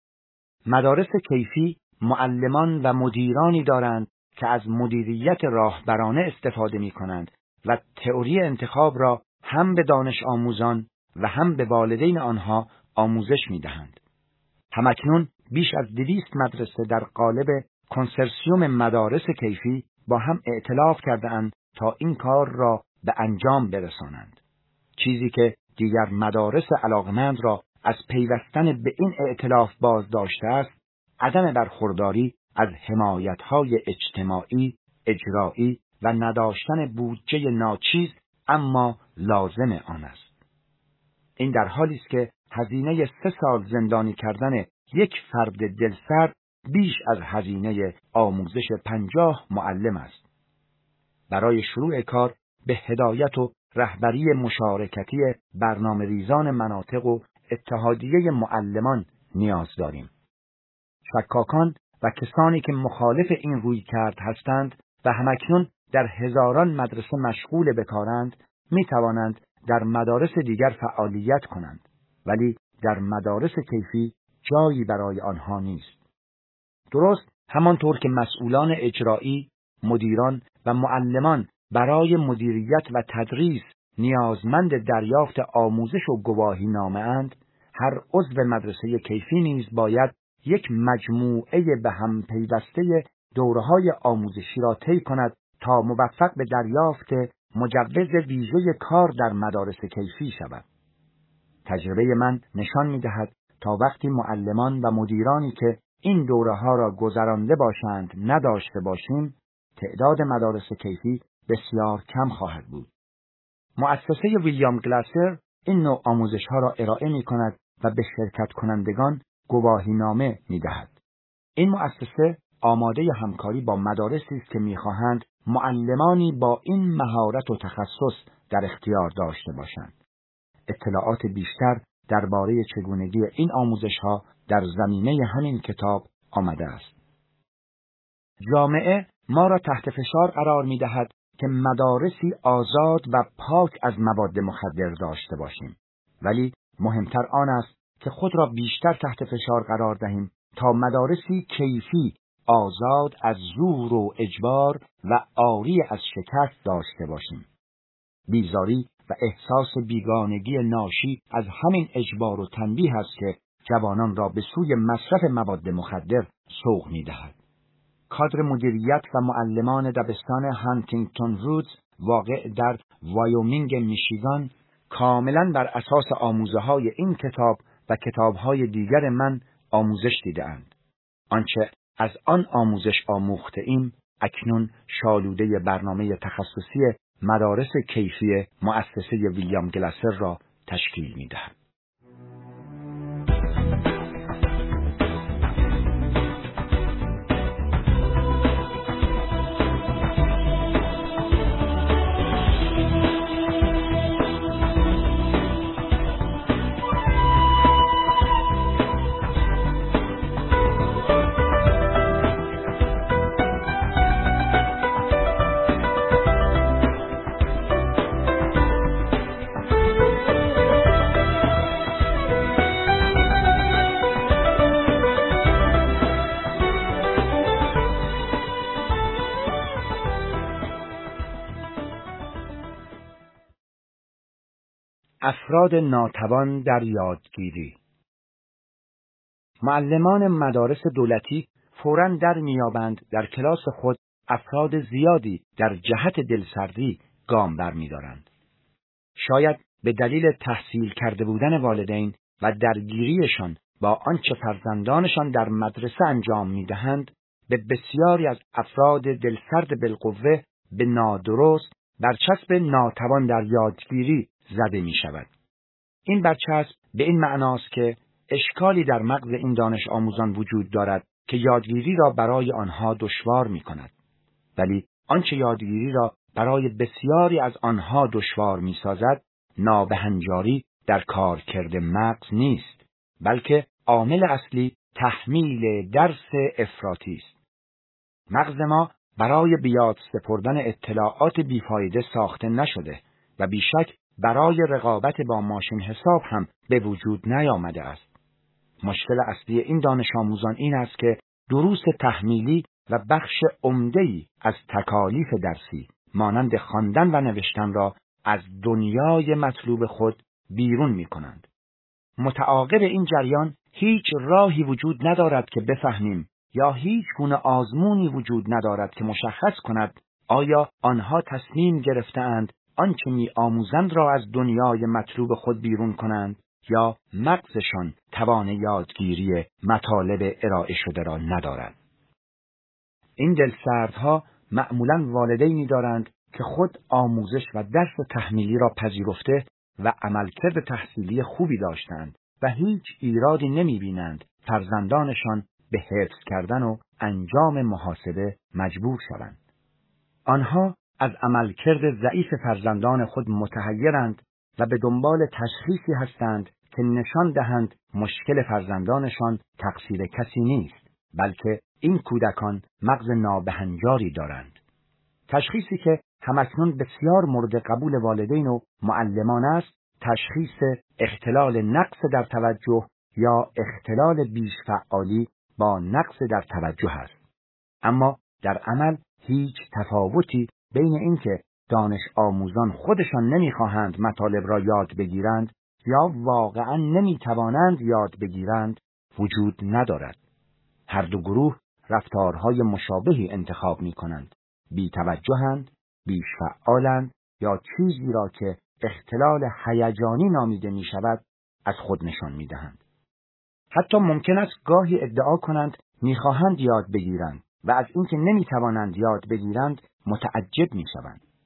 مدارس کیفی معلمان و مدیرانی دارند که از مدیریت راهبرانه استفاده می کنند و تئوری انتخاب را هم به دانش آموزان و هم به والدین آنها آموزش می دهند. همکنون بیش از دویست مدرسه در قالب کنسرسیوم مدارس کیفی با هم ائتلاف کرده اند تا این کار را به انجام برسانند. چیزی که دیگر مدارس علاقمند را از پیوستن به این ائتلاف باز داشته است، عدم برخورداری از حمایت‌های اجتماعی، اجرایی و نداشتن بودجه ناچیز اما لازم آن است. این در حالی است که هزینه سه سال زندانی کردن یک فرد دلسرد بیش از هزینه آموزش پنجاه معلم است. برای شروع کار به هدایت و رهبری مشارکتی برنامه ریزان مناطق و اتحادیه معلمان نیاز داریم. شکاکان و کسانی که مخالف این روی کرد هستند و همکنون در هزاران مدرسه مشغول به کارند، می توانند در مدارس دیگر فعالیت کنند، ولی در مدارس کیفی جایی برای آنها نیست. درست همانطور که مسئولان اجرایی، مدیران و معلمان برای مدیریت و تدریس نیازمند دریافت آموزش و گواهی نامه اند، هر عضو مدرسه کیفی نیز باید یک مجموعه به هم پیوسته دوره‌های آموزشی را طی کند تا موفق به دریافت مجوز ویژه کار در مدارس کیفی شود. تجربه من نشان می‌دهد تا وقتی معلمان و مدیرانی که این دوره‌ها را گذرانده باشند نداشته باشیم، تعداد مدارس کیفی بسیار کم خواهد بود. مؤسسه ویلیام گلاسر این نوع آموزش‌ها را ارائه می‌کند و به شرکت کنندگان گواهینامه می‌دهد. این مؤسسه آماده همکاری با مدارسی است که می‌خواهند معلمانی با این مهارت و تخصص در اختیار داشته باشند. اطلاعات بیشتر درباره چگونگی این آموزش‌ها در زمینه همین کتاب آمده است. جامعه ما را تحت فشار قرار می‌دهد که مدارسی آزاد و پاک از مواد مخدر داشته باشیم، ولی مهمتر آن است که خود را بیشتر تحت فشار قرار دهیم تا مدارسی کیفی، آزاد از زور و اجبار و عاری از شکست داشته باشیم. بیزاری و احساس بیگانگی ناشی از همین اجبار و تنبیه است که جوانان را به سوی مصرف مواد مخدر سوق می‌دهد. کادر مدیریت و معلمان دبستان هانتینگتون رودز واقع در وایومینگ میشیگان کاملاً بر اساس آموزه‌های این کتاب و کتاب‌های دیگر من آموزش دیده‌اند. آنچه از آن آموزش آموخته ایم اکنون شالوده برنامه تخصصی مدارس کیفی مؤسسه ویلیام گلاسر را تشکیل می‌دهد. افراد ناتوان در یادگیری. معلمان مدارس دولتی فوراً در میابند در کلاس خود افراد زیادی در جهت دلسردی گام برمی‌دارند. شاید به دلیل تحصیل کرده بودن والدین و درگیریشان با آنچه فرزندانشان در مدرسه انجام می‌دهند، به بسیاری از افراد دلسرد بالقوه به نادرست برچسب ناتوان در یادگیری زده می شود. این برچسب به این معناست که اشکالی در مغز این دانش آموزان وجود دارد که یادگیری را برای آنها دشوار می کند. ولی آنچه یادگیری را برای بسیاری از آنها دشوار می سازد، نابهنجاری در کارکرد مغز نیست، بلکه عامل اصلی تحمیل درس افراطی است. مغز ما برای به یاد سپردن اطلاعات بیفایده ساخته نشده و بیشک برای رقابت با ماشین حساب هم به وجود نیامده است. مشکل اصلی این دانش آموزان این است که دروس تحمیلی و بخش عمده‌ای از تکالیف درسی مانند خواندن و نوشتن را از دنیای مطلوب خود بیرون می کنند. متعاقب این جریان هیچ راهی وجود ندارد که بفهمیم یا هیچ گونه آزمونی وجود ندارد که مشخص کند آیا آنها تصمیم گرفته‌اند آنچه می آموزند را از دنیای مطلوب خود بیرون کنند یا مغزشان توان یادگیری مطالب ارائه شده را ندارد. این دلسردها معمولاً والدینی دارند که خود آموزش و درس تحمیلی را پذیرفته و عملکرد تحصیلی خوبی داشتند و هیچ ایرادی نمی بینند فرزندانشان به حفظ کردن و انجام محاسبه مجبور شوند. آنها از عملکرد ضعیف فرزندان خود متحیرند و به دنبال تشخیصی هستند که نشان دهند مشکل فرزندانشان تقصیر کسی نیست، بلکه این کودکان مغز نابهنجاری دارند. تشخیصی که همکنون بسیار مورد قبول والدین و معلمان است، تشخیص اختلال نقص در توجه یا اختلال بیش فعالی با نقص در توجه است. اما در عمل هیچ تفاوتی بین اینکه دانش آموزان خودشان نمیخواهند مطالب را یاد بگیرند یا واقعا نمیتوانند یاد بگیرند وجود ندارد. هر دو گروه رفتارهای مشابهی انتخاب میکنند. بی توجهند، بیش فعالند یا چیزی را که اختلال هیجانی نامیده می شود از خود نشان می دهند. حتی ممکن است گاهی ادعا کنند می خواهند یاد بگیرند و از اینکه نمی توانند یاد بگیرند متعجب می شوند.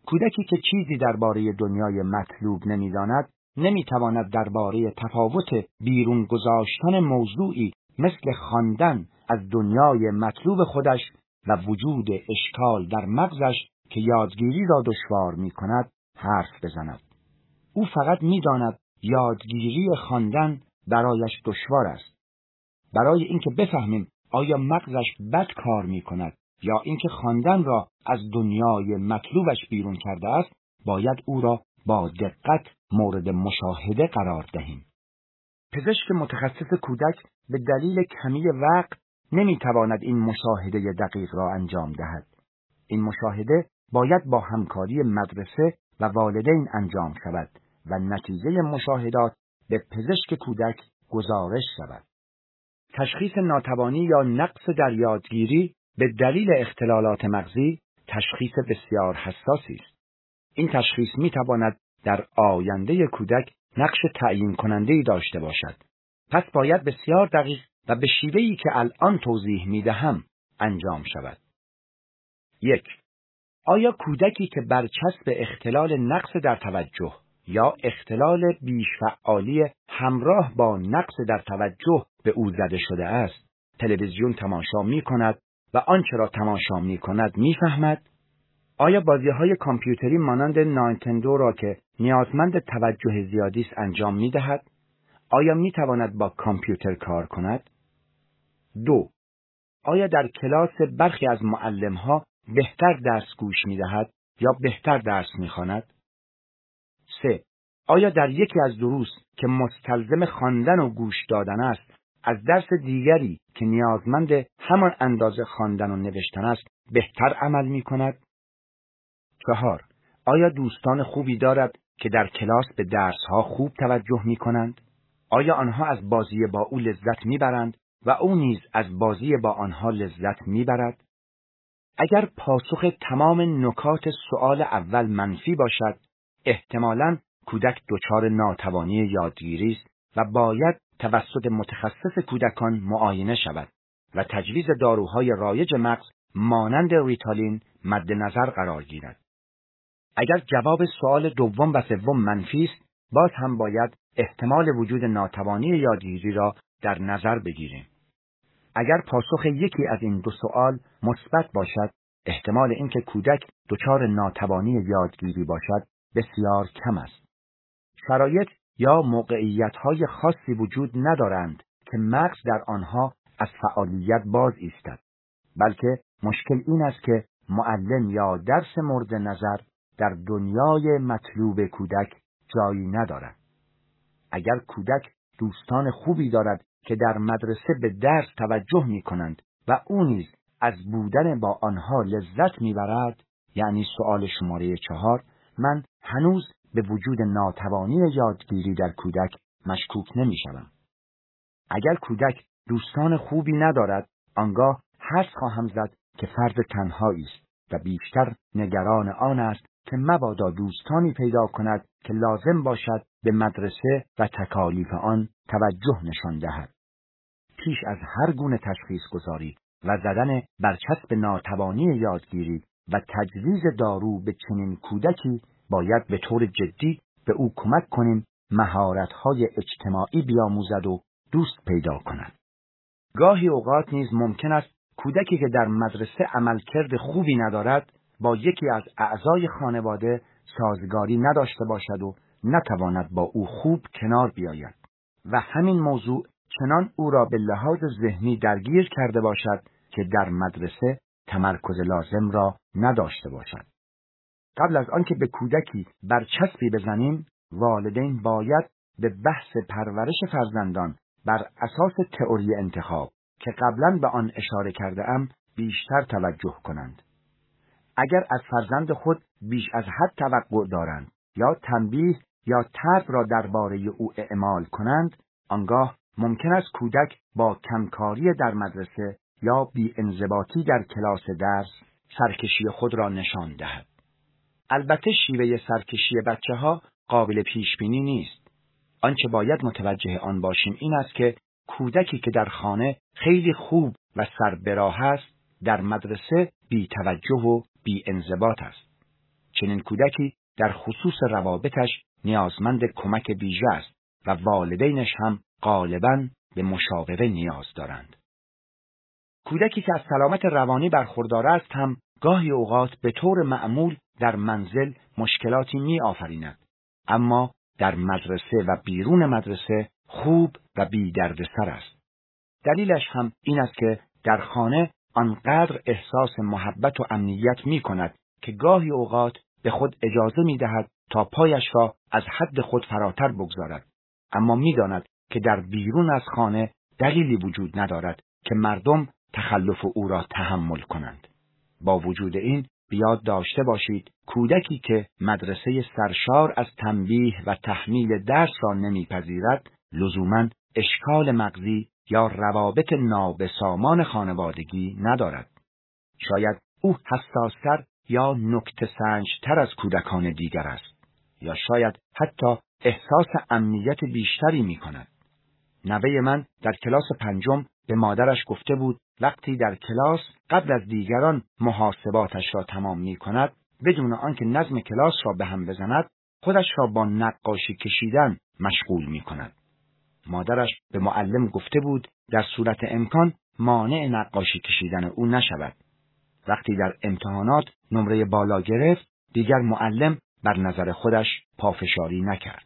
کودکی که چیزی درباره دنیای مطلوب نمی‌داند، نمی‌تواند درباره تفاوت بیرون گذاشتن موضوعی مثل خواندن از دنیای مطلوب خودش و وجود اشکال در مغزش که یادگیری را دشوار می‌کند حرف بزند. او فقط می‌داند یادگیری خواندن برایش دشوار است. برای اینکه بفهمیم آیا مغزش بد کار می‌کند یا اینکه خواندن را از دنیای مطلوبش بیرون کرده است، باید او را با دقت مورد مشاهده قرار دهیم. پزشک متخصص کودک به دلیل کمی وقت نمی‌تواند این مشاهده دقیق را انجام دهد. این مشاهده باید با همکاری مدرسه و والدین انجام شود و نتیجه مشاهدات به پزشک کودک گزارش شود. تشخیص ناتوانی یا نقص در یادگیری به دلیل اختلالات مغزی تشخیص بسیار حساسی است. این تشخیص می‌تواند در آینده کودک نقش تعیین کننده‌ای داشته باشد. پس باید بسیار دقیق و به شیوهی که الان توضیح می‌دهم انجام شود. یک. آیا کودکی که برچسب اختلال نقص در توجه یا اختلال بیش‌فعالی همراه با نقص در توجه به او زده شده است، تلویزیون تماشا می‌کند و آنچه را تماشا می‌کند می‌فهمد؟ آیا بازی‌های کامپیوتری مانند نینتندو را که نیازمند توجه زیادی است انجام می‌دهد؟ آیا می‌تواند با کامپیوتر کار کند؟ دو. آیا در کلاس برخی از معلم‌ها بهتر درس گوش می‌دهد یا بهتر درس می‌خواند؟ سه. آیا در یکی از دروس که مستلزم خواندن و گوش دادن است، از درس دیگری که نیازمند همان اندازه خواندن و نوشتن است بهتر عمل می‌کند؟ چهار. آیا دوستان خوبی دارد که در کلاس به درس‌ها خوب توجه می‌کنند؟ آیا آنها از بازی با او لذت می‌برند و او نیز از بازی با آنها لذت می‌برد؟ اگر پاسخ تمام نکات سؤال اول منفی باشد، احتمالاً کودک دچار ناتوانی یادگیری است و باید توسط متخصص کودکان معاینه شود و تجویز داروهای رایج مغز مانند ریتالین مد نظر قرار گیرد. اگر جواب سؤال دوم و سوم منفی است، باز هم باید احتمال وجود ناتوانی یادگیری را در نظر بگیریم. اگر پاسخ یکی از این دو سؤال مثبت باشد، احتمال اینکه کودک دچار ناتوانی یادگیری باشد بسیار کم است. شرایط یا موقعیت‌های خاصی وجود ندارند که مغز در آنها از فعالیت باز ایستد، بلکه مشکل این است که معلم یا درس مورد نظر در دنیای مطلوب کودک جایی ندارد. اگر کودک دوستان خوبی دارد که در مدرسه به درس توجه می کنند و او نیز از بودن با آنها لذت می برد، یعنی سؤال شماره چهار، من هنوز به وجود ناتوانی یادگیری در کودک مشکوک نمی شوم. اگر کودک دوستان خوبی ندارد، آنگاه حدس خواهم زد که فرد تنهایی است و بیشتر نگران آن است که مبادا دوستانی پیدا کند که لازم باشد به مدرسه و تکالیف آن توجه نشان دهد. پیش از هر گونه تشخیص گذاری و زدن برچسب ناتوانی یادگیری و تجویز دارو به چنین کودکی باید به طور جدی به او کمک کنیم مهارت‌های اجتماعی بیاموزد و دوست پیدا کند. گاهی اوقات نیز ممکن است کودکی که در مدرسه عملکرد خوبی ندارد با یکی از اعضای خانواده سازگاری نداشته باشد و نتواند با او خوب کنار بیاید و همین موضوع چنان او را به لحاظ ذهنی درگیر کرده باشد که در مدرسه تمرکز لازم را نداشته باشد. قبل از آنکه به کودکی برچسبی بزنیم، والدین باید به بحث پرورش فرزندان بر اساس تئوری انتخاب که قبلا به آن اشاره کرده ام بیشتر توجه کنند. اگر از فرزند خود بیش از حد توقع دارند یا تنبیه یا طرد را درباره او اعمال کنند، آنگاه ممکن است کودک با کمکاری در مدرسه یا بی‌انضباطی در کلاس درس سرکشی خود را نشان دهد. البته شیوه سرکشی بچه‌ها قابل پیش بینی نیست. آنچه باید متوجه آن باشیم این است که کودکی که در خانه خیلی خوب و سر به راه است، در مدرسه بی توجه و بی انضباط است. چنین کودکی در خصوص روابطش نیازمند کمک ویژه است و والدینش هم غالباً به مشاوره نیاز دارند. کودکی که از سلامت روانی برخوردار است هم گاهی اوقات به طور معمول در منزل مشکلاتی می آفریند، اما در مدرسه و بیرون مدرسه خوب و بی دردسر است. دلیلش هم این است که در خانه آنقدر احساس محبت و امنیت می کند که گاهی اوقات به خود اجازه می دهد تا پایش را از حد خود فراتر بگذارد، اما می داند که در بیرون از خانه دلیلی وجود ندارد که مردم تخلف او را تحمل کنند. با وجود این بیاد داشته باشید کودکی که مدرسه سرشار از تنبیه و تحمیل درس را نمیپذیرد لزوماً اشکال مغزی یا روابط نابسامان خانوادگی ندارد. شاید او حساس‌تر یا نکته سنج‌تر از کودکان دیگر است، یا شاید حتی احساس امنیت بیشتری می کند. نوه من در کلاس پنجم به مادرش گفته بود وقتی در کلاس قبل از دیگران محاسباتش را تمام می کند، بدون آنکه نظم کلاس را به هم بزند، خودش را با نقاشی کشیدن مشغول می کند. مادرش به معلم گفته بود در صورت امکان مانع نقاشی کشیدن او نشود. وقتی در امتحانات نمره بالا گرفت، دیگر معلم بر نظر خودش پافشاری نکرد.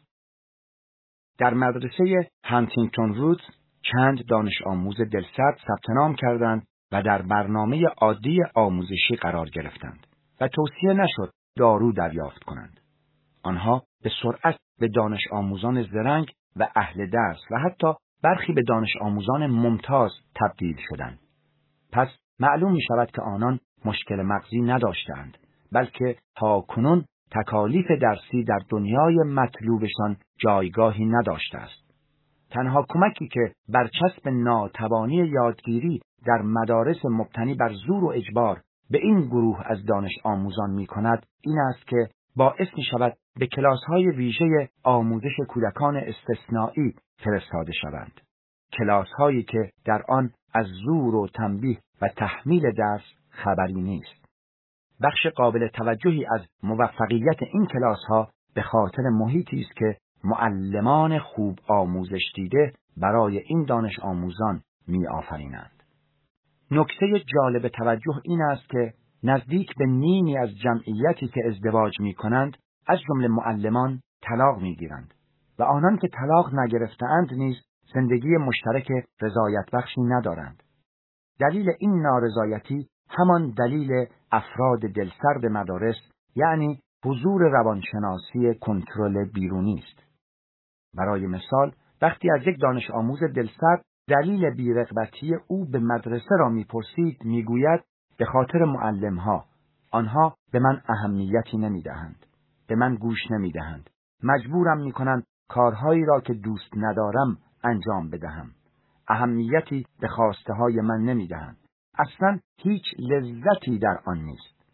در مدرسه هانتینگتون رودز چند دانش آموز دلسرد ثبت نام کردند و در برنامه عادی آموزشی قرار گرفتند و توصیه نشد دارو دریافت کنند. آنها به سرعت به دانش آموزان زرنگ و اهل درس و حتی برخی به دانش آموزان ممتاز تبدیل شدند. پس معلوم می شود که آنان مشکل مغزی نداشتند، بلکه تاکنون تکالیف درسی در دنیای مطلوبشان جایگاهی نداشته است. تنها کمکی که برچسب ناتوانی یادگیری در مدارس مبتنی بر زور و اجبار به این گروه از دانش آموزان می کند این است که باعث می شود به کلاس‌های ویژه آموزش کودکان استثنایی فرستاده شوند. کلاس‌هایی که در آن از زور و تنبیه و تحمیل درس خبری نیست. بخش قابل توجهی از موفقیت این کلاس‌ها به خاطر محیطی است که معلمان خوب آموزش دیده برای این دانش آموزان می آفرینند. نکته جالب توجه این است که نزدیک به نیمی از جمعیتی که ازدواج می کنند از جمله معلمان طلاق می گیرند و آنان که طلاق نگرفتند نیز زندگی مشترک رضایت بخشی ندارند. دلیل این نارضایتی همان دلیل افراد دلسرد مدارس، یعنی حضور روانشناسی کنترل بیرونی است. برای مثال وقتی از یک دانش آموز دلسرد دلیل بی‌رغبتی او به مدرسه را می‌پرسید، می‌گوید به خاطر معلم‌ها، آنها به من اهمیتی نمی‌دهند، به من گوش نمی‌دهند، مجبورم می‌کنند کارهایی را که دوست ندارم انجام بدهم، اهمیتی به خواسته‌های من نمی‌دهند، اصلاً هیچ لذتی در آن نیست.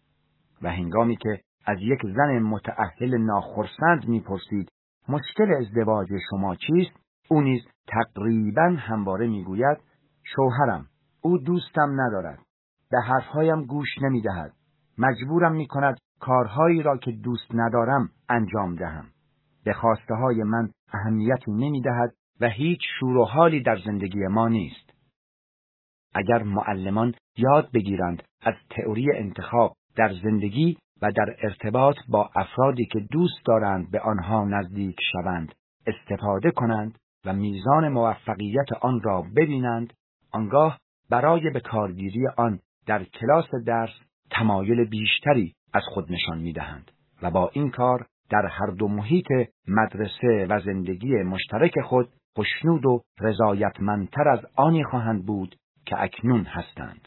و هنگامی که از یک زن متأهل ناخرسند می‌پرسید مشکل ازدواج شما چیست، او نیز تقریباً همواره میگوید شوهرم، او دوستم ندارد، به حرفهایم گوش نمیدهد، مجبورم میکند کارهایی را که دوست ندارم انجام دهم، به خواسته های من اهمیتی نمیدهد و هیچ شور و حالی در زندگی ما نیست. اگر معلمان یاد بگیرند از تئوری انتخاب در زندگی و در ارتباط با افرادی که دوست دارند به آنها نزدیک شوند استفاده کنند و میزان موفقیت آن را ببینند، آنگاه برای به کارگیری آن در کلاس درس تمایل بیشتری از خود نشان می‌دهند و با این کار در هر دو محیط مدرسه و زندگی مشترک خود خوشنود و رضایتمندتر از آنی خواهند بود که اکنون هستند.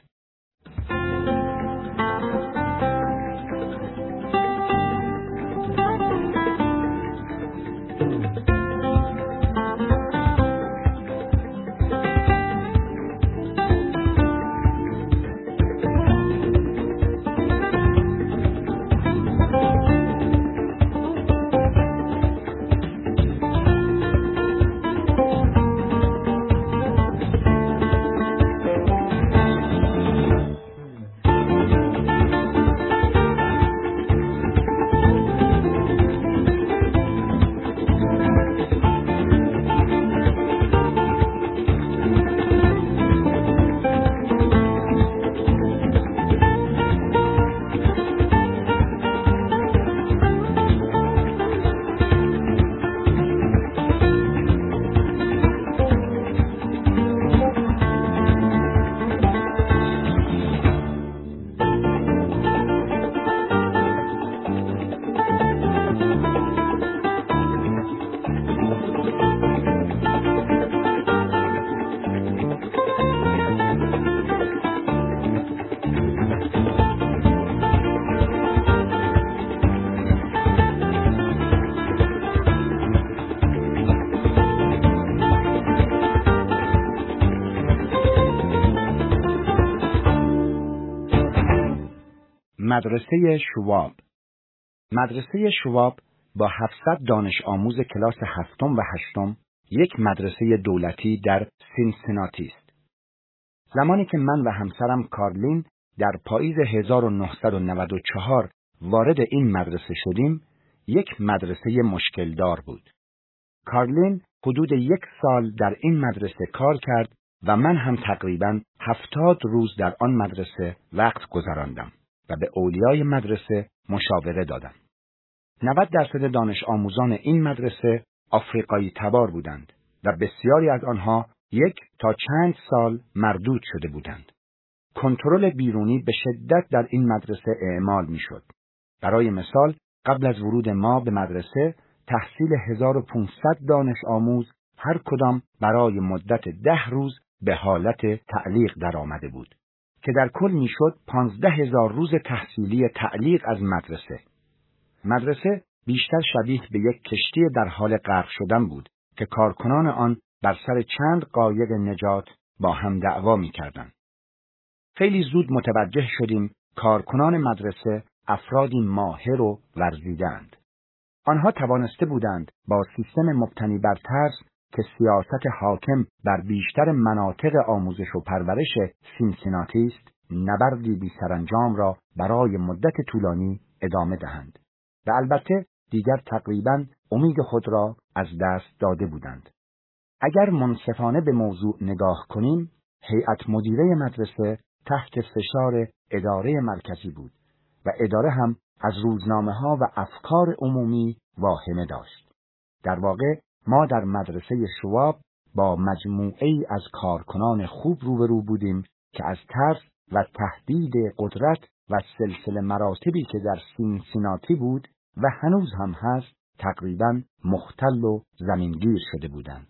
مدرسه شواب. مدرسه شواب با هفتصد دانش آموز کلاس هفتم و هشتم یک مدرسه دولتی در سینسیناتی است. زمانی که من و همسرم کارلین در پاییز هزار و نهصد و نود و چهار وارد این مدرسه شدیم، یک مدرسه مشکلدار بود. کارلین حدود یک سال در این مدرسه کار کرد و من هم تقریباً هفتاد روز در آن مدرسه وقت گذراندم و به اولیای مدرسه مشاوره دادم. نود درصد دانش آموزان این مدرسه آفریقایی تبار بودند و بسیاری از آنها یک تا چند سال مردود شده بودند. کنترل بیرونی به شدت در این مدرسه اعمال می‌شد. برای مثال، قبل از ورود ما به مدرسه، تحصیل هزار و پانصد دانش آموز هر کدام برای مدت ده روز به حالت تعلیق در آمده بود که در کل میشد پانزده هزار روز تحصیلی تعلیق از مدرسه. مدرسه بیشتر شبیه به یک کشتی در حال غرق شدن بود که کارکنان آن بر سر چند قایق نجات با هم دعوا می‌کردند. خیلی زود متوجه شدیم کارکنان مدرسه افرادی ماهر و ورزیده‌اند. آنها توانسته بودند با سیستم مبتنی بر ترس که سیاست حاکم بر بیشتر مناطق آموزش و پرورش سینسیناتی است، نبردی بی سرانجام را برای مدت طولانی ادامه دهند. و البته دیگر تقریباً امید خود را از دست داده بودند. اگر منصفانه به موضوع نگاه کنیم، هیئت مدیره مدرسه تحت فشار اداره مرکزی بود و اداره هم از روزنامه‌ها و افکار عمومی واهمه داشت. در واقع ما در مدرسه شواب با مجموعه‌ای از کارکنان خوب روبرو بودیم که از ترس و تهدید قدرت و سلسله مراتبی که در سینسیناتی بود و هنوز هم هست تقریباً مختل و زمینگیر شده بودند.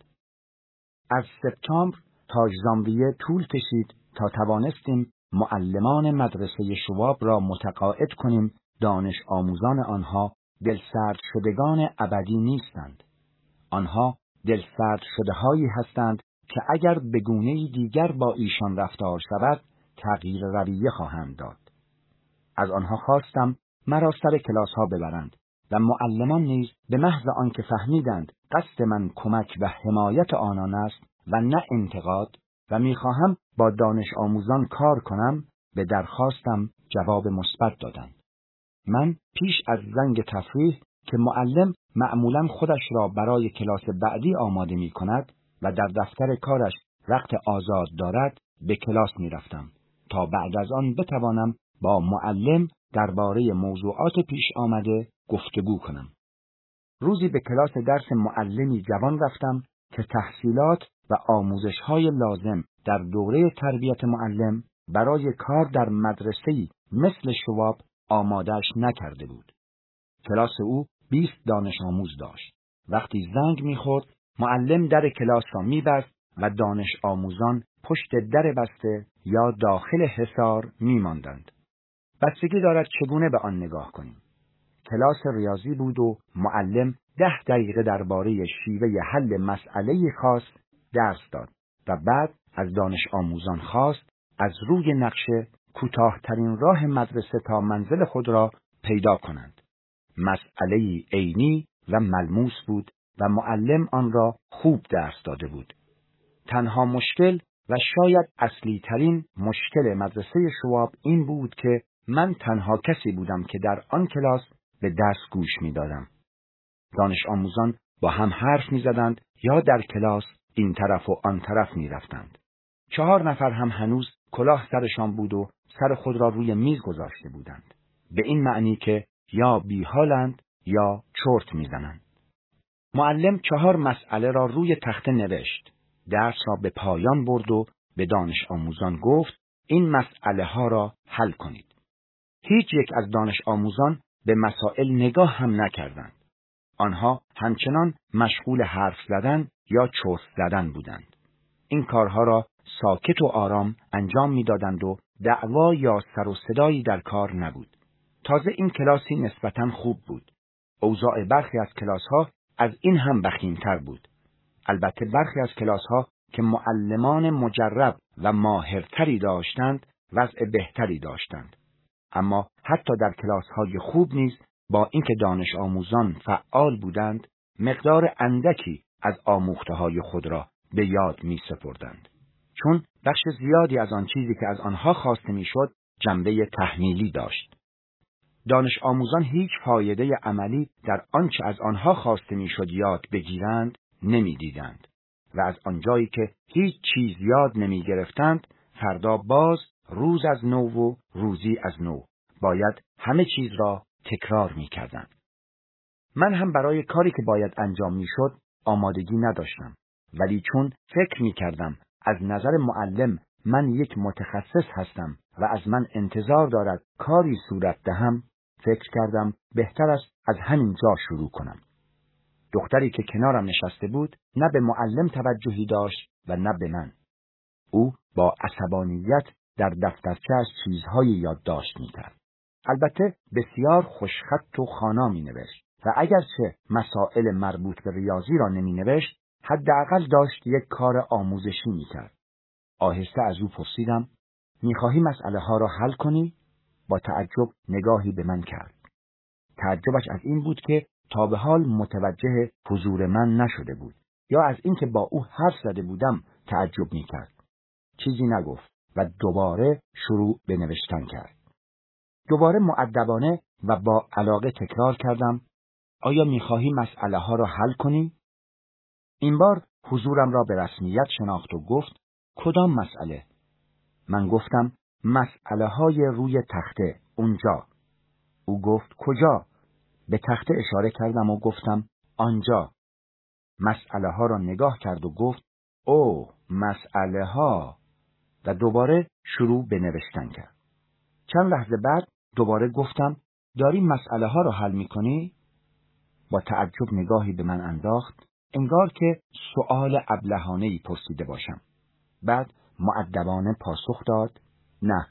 از سپتامبر تا ژانویه طول کشید تا توانستیم معلمان مدرسه شواب را متقاعد کنیم دانش آموزان آنها دلسرد شدگان ابدی نیستند. آنها دلسرد شده‌هایی هستند که اگر به گونه‌ای دیگر با ایشان رفتار شود تغییر رویه خواهند داد. از آنها خواستم مرا سر کلاس‌ها ببرند و معلمان نیز به محض آنکه فهمیدند قصد من کمک و حمایت آنان است و نه انتقاد و می‌خواهم با دانش آموزان کار کنم، به درخواستم جواب مثبت دادند. من پیش از زنگ تفریح که معلم معمولاً خودش را برای کلاس بعدی آماده می‌کند و در دفتر کارش وقت آزاد دارد به کلاس می‌رفتم تا بعد از آن بتوانم با معلم درباره موضوعات پیش آمده گفتگو کنم. روزی به کلاس درس معلمی جوان رفتم که تحصیلات و آموزش‌های لازم در دوره تربیت معلم برای کار در مدرسه‌ای مثل شواب آماده‌اش نکرده بود. کلاس او بیست دانش آموز داشت. وقتی زنگ می‌خورد، معلم در کلاس را می‌بست و دانش آموزان پشت در بسته یا داخل حصار می‌ماندند. بستگی دارد چگونه به آن نگاه کنیم. کلاس ریاضی بود و معلم ده دقیقه درباره شیوه حل مسئله خاص درس داد و بعد از دانش آموزان خواست از روی نقشه کوتاه‌ترین راه مدرسه تا منزل خود را پیدا کنند. مسئله عینی و ملموس بود و معلم آن را خوب درس داده بود. تنها مشکل و شاید اصلی ترین مشکل مدرسه شواب این بود که من تنها کسی بودم که در آن کلاس به درس گوش می دادم. دانش آموزان با هم حرف می زدند یا در کلاس این طرف و آن طرف می رفتند. چهار نفر هم هنوز کلاه سرشان بود و سر خود را روی میز گذاشته بودند. به این معنی که یا بیحالند یا چرت می زنند. معلم چهار مسئله را روی تخته نوشت. درس را به پایان برد و به دانش آموزان گفت این مسئله ها را حل کنید. هیچ یک از دانش آموزان به مسائل نگاه هم نکردند. آنها همچنان مشغول حرف زدن یا چرت زدن بودند. این کارها را ساکت و آرام انجام می‌دادند و دعوا یا سر و صدایی در کار نبود. تازه این کلاسی نسبتاً خوب بود. اوضاع برخی از کلاس‌ها از این هم وخیم‌تر بود. البته برخی از کلاس‌ها که معلمان مجرب و ماهرتری داشتند وضع بهتری داشتند. اما حتی در کلاس‌های خوب نیز با اینکه دانش آموزان فعال بودند، مقدار اندکی از آموخته‌های خود را به یاد می‌سپردند. چون بخش زیادی از آن چیزی که از آنها خواسته می‌شد جنبه تحمیلی داشت. دانش آموزان هیچ فایده عملی در آنچه از آنها خواسته می‌شد یاد بگیرند نمی‌دیدند و از آنجایی که هیچ چیز یاد نمی‌گرفتند، فردا باز روز از نو و روزی از نو باید همه چیز را تکرار می‌کردند. من هم برای کاری که باید انجام می‌شد آمادگی نداشتم، ولی چون فکر می‌کردم از نظر معلم من یک متخصص هستم و از من انتظار دارد کاری صورت دهم، فکر کردم بهتر است از همین جا شروع کنم. دختری که کنارم نشسته بود نه به معلم توجهی داشت و نه به من. او با عصبانیت در دفترچه‌اش چیزهای یادداشت می‌کرد. البته بسیار خوشخط و خوانا می‌نوشت و اگرچه مسائل مربوط به ریاضی را نمی‌نوشت، حداقل داشت یک کار آموزشی می‌کرد. آهسته از او پرسیدم: می‌خواهی مسئله ها را حل کنی؟ با تعجب نگاهی به من کرد. تعجبش از این بود که تا به حال متوجه حضور من نشده بود، یا از اینکه با او حرف زده بودم تعجب می‌کرد. چیزی نگفت و دوباره شروع به نوشتن کرد. دوباره مؤدبانه و با علاقه تکرار کردم: آیا می‌خواهی مسئله ها را حل کنی؟ این بار حضورم را به رسمیت شناخت و گفت: کدام مسئله؟ من گفتم: مسئله های روی تخته اونجا. او گفت: کجا؟ به تخته اشاره کردم و گفتم: آنجا. مسئله ها را نگاه کرد و گفت: اوه، مسئله ها. و دوباره شروع به نوشتن کرد. چند لحظه بعد دوباره گفتم: داری مسئله ها را حل می کنی؟ با تعجب نگاهی به من انداخت، انگار که سؤال ابلهانه‌ای پرسیده باشم. بعد مؤدبانه پاسخ داد: نه.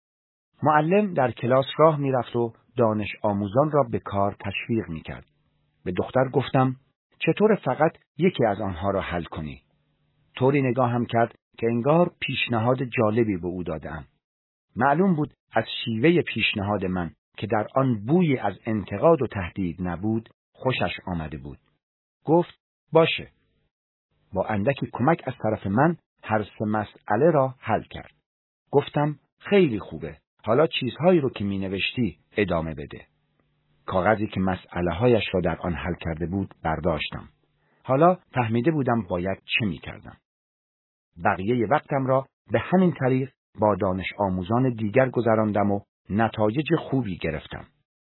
معلم در کلاس راه می رفت و دانش آموزان را به کار تشویق می کرد. به دختر گفتم: چطور فقط یکی از آنها را حل کنی؟ طوری نگاه هم کرد که انگار پیشنهاد جالبی به او دادم. معلوم بود از شیوه پیشنهاد من که در آن بویی از انتقاد و تهدید نبود خوشش آمده بود. گفت: باشه. با اندکی کمک از طرف من هر سه مسئله را حل کرد. گفتم: خیلی خوبه. حالا چیزهایی رو که می نوشتی ادامه بده. کاغذی که مسئله هایش را در آن حل کرده بود برداشتم. حالا فهمیده بودم باید چه می کردم. بقیه وقتم را به همین طریق با دانش آموزان دیگر گذراندم و نتایج خوبی گرفتم.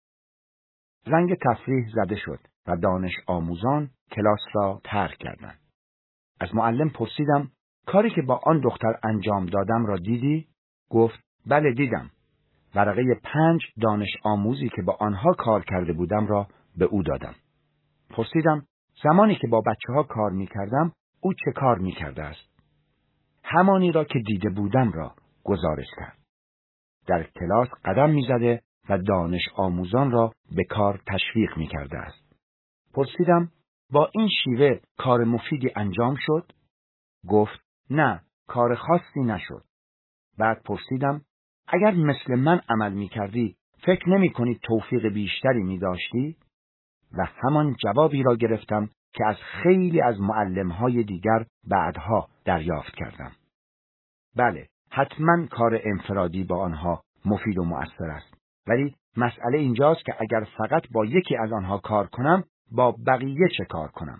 زنگ تفریح زده شد و دانش آموزان کلاس را ترک کردند. از معلم پرسیدم: کاری که با آن دختر انجام دادم را دیدی؟ گفت: بله دیدم. ورقه پنج دانش آموزی که با آنها کار کرده بودم را به او دادم. پرسیدم: زمانی که با بچه ها کار می کردم او چه کار می کرده است؟ همانی را که دیده بودم را گزارش کرد. در کلاس قدم می زده و دانش آموزان را به کار تشویق می کرده است. پرسیدم: با این شیوه کار مفیدی انجام شد؟ گفت: نه، کار خاصی نشد. بعد پرسیدم: اگر مثل من عمل می کردی، فکر نمی کنی توفیق بیشتری می داشتی؟ و همان جوابی را گرفتم که از خیلی از معلم‌های دیگر بعدها دریافت کردم. بله، حتما کار انفرادی با آنها مفید و مؤثر است. ولی مسئله اینجاست که اگر فقط با یکی از آنها کار کنم، با بقیه چه کار کنم؟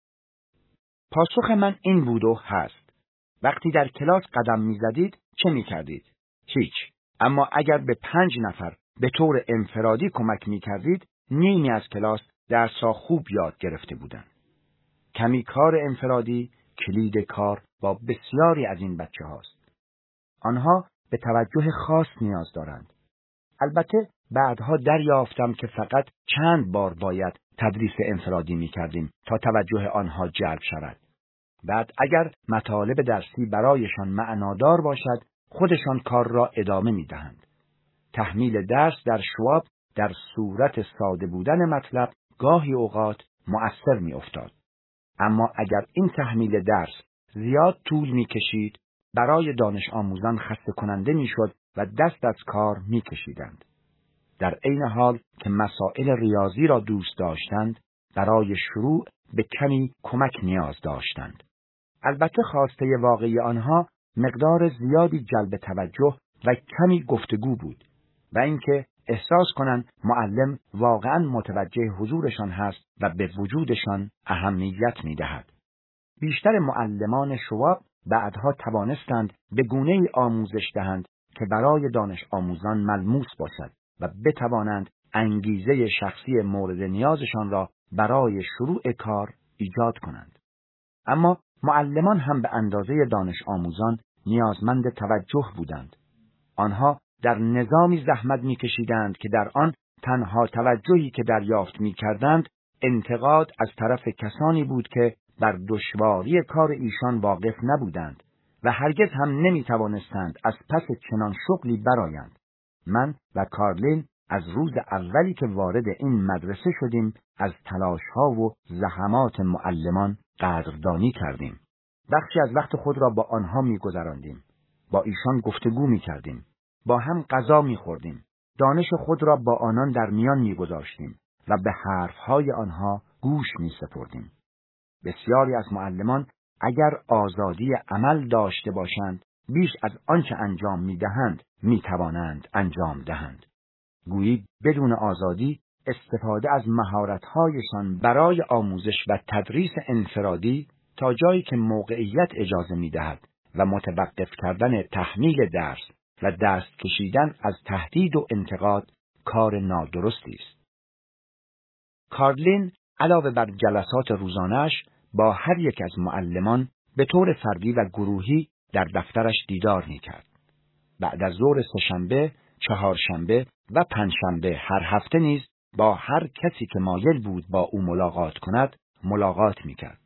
پاسخ من این بود و هست: وقتی در کلاس قدم می زدید، چه می کردید؟ هیچ. اما اگر به پنج نفر به طور انفرادی کمک می کردید، نیمی از کلاس درس‌ها خوب یاد گرفته بودند. کمی کار انفرادی کلید کار با بسیاری از این بچه هاست. آنها به توجه خاص نیاز دارند. البته بعدها دریافتم که فقط چند بار باید تدریس انفرادی می کردیم تا توجه آنها جلب شود. بعد اگر مطالب درسی برایشان معنادار باشد، خودشان کار را ادامه می دهند. تحمیل درس در شواب در صورت ساده بودن مطلب گاهی اوقات مؤثر می افتاد. اما اگر این تحمیل درس زیاد طول می کشید، برای دانش آموزان خسته کننده می شد و دست از کار می کشیدند. در عین حال که مسائل ریاضی را دوست داشتند، برای شروع به کمی کمک نیاز داشتند. البته خواسته واقعی آنها مقدار زیادی جلب توجه و کمی گفتگو بود و اینکه احساس کنند معلم واقعاً متوجه حضورشان هست و به وجودشان اهمیت می‌دهد. بیشتر معلمان شواب بعدها توانستند به گونه‌ای آموزش دهند که برای دانش آموزان ملموس باشد و بتوانند انگیزه شخصی مورد نیازشان را برای شروع کار ایجاد کنند. اما معلمان هم به اندازه دانش آموزان نیازمند توجه بودند. آنها در نظامی زحمت می‌کشیدند که در آن تنها توجهی که دریافت می‌کردند انتقاد از طرف کسانی بود که بر دشواری کار ایشان واقف نبودند و هرگز هم نمی‌توانستند از پس چنان شغلی برآیند. من و کارلین از روز اولی که وارد این مدرسه شدیم از تلاش‌ها و زحمات معلمان قدردانی کردیم. بخشی از وقت خود را با آنها می‌گذراندیم. با ایشان گفتگو می‌کردیم. با هم غذا می‌خوردیم. دانش خود را با آنان در میان می‌گذاشتیم و به حرف‌های آنها گوش می‌سپردیم. بسیاری از معلمان اگر آزادی عمل داشته باشند، بیش از آنچه انجام می‌دهند می‌توانند انجام دهند. گویی بدون آزادی استفاده از مهارت‌هایشان برای آموزش و تدریس انفرادی تا جایی که موقعیت اجازه می‌دهد و متوقف کردن تحمیل درس و دست کشیدن از تهدید و انتقاد کار نادرستی است. کارلین علاوه بر جلسات روزانه‌اش با هر یک از معلمان به طور فردی و گروهی در دفترش دیدار می‌کرد. بعد از ظهر سه‌شنبه، چهارشنبه و پنجشنبه هر هفته نیز با هر کسی که مایل بود با او ملاقات کند ملاقات می‌کرد.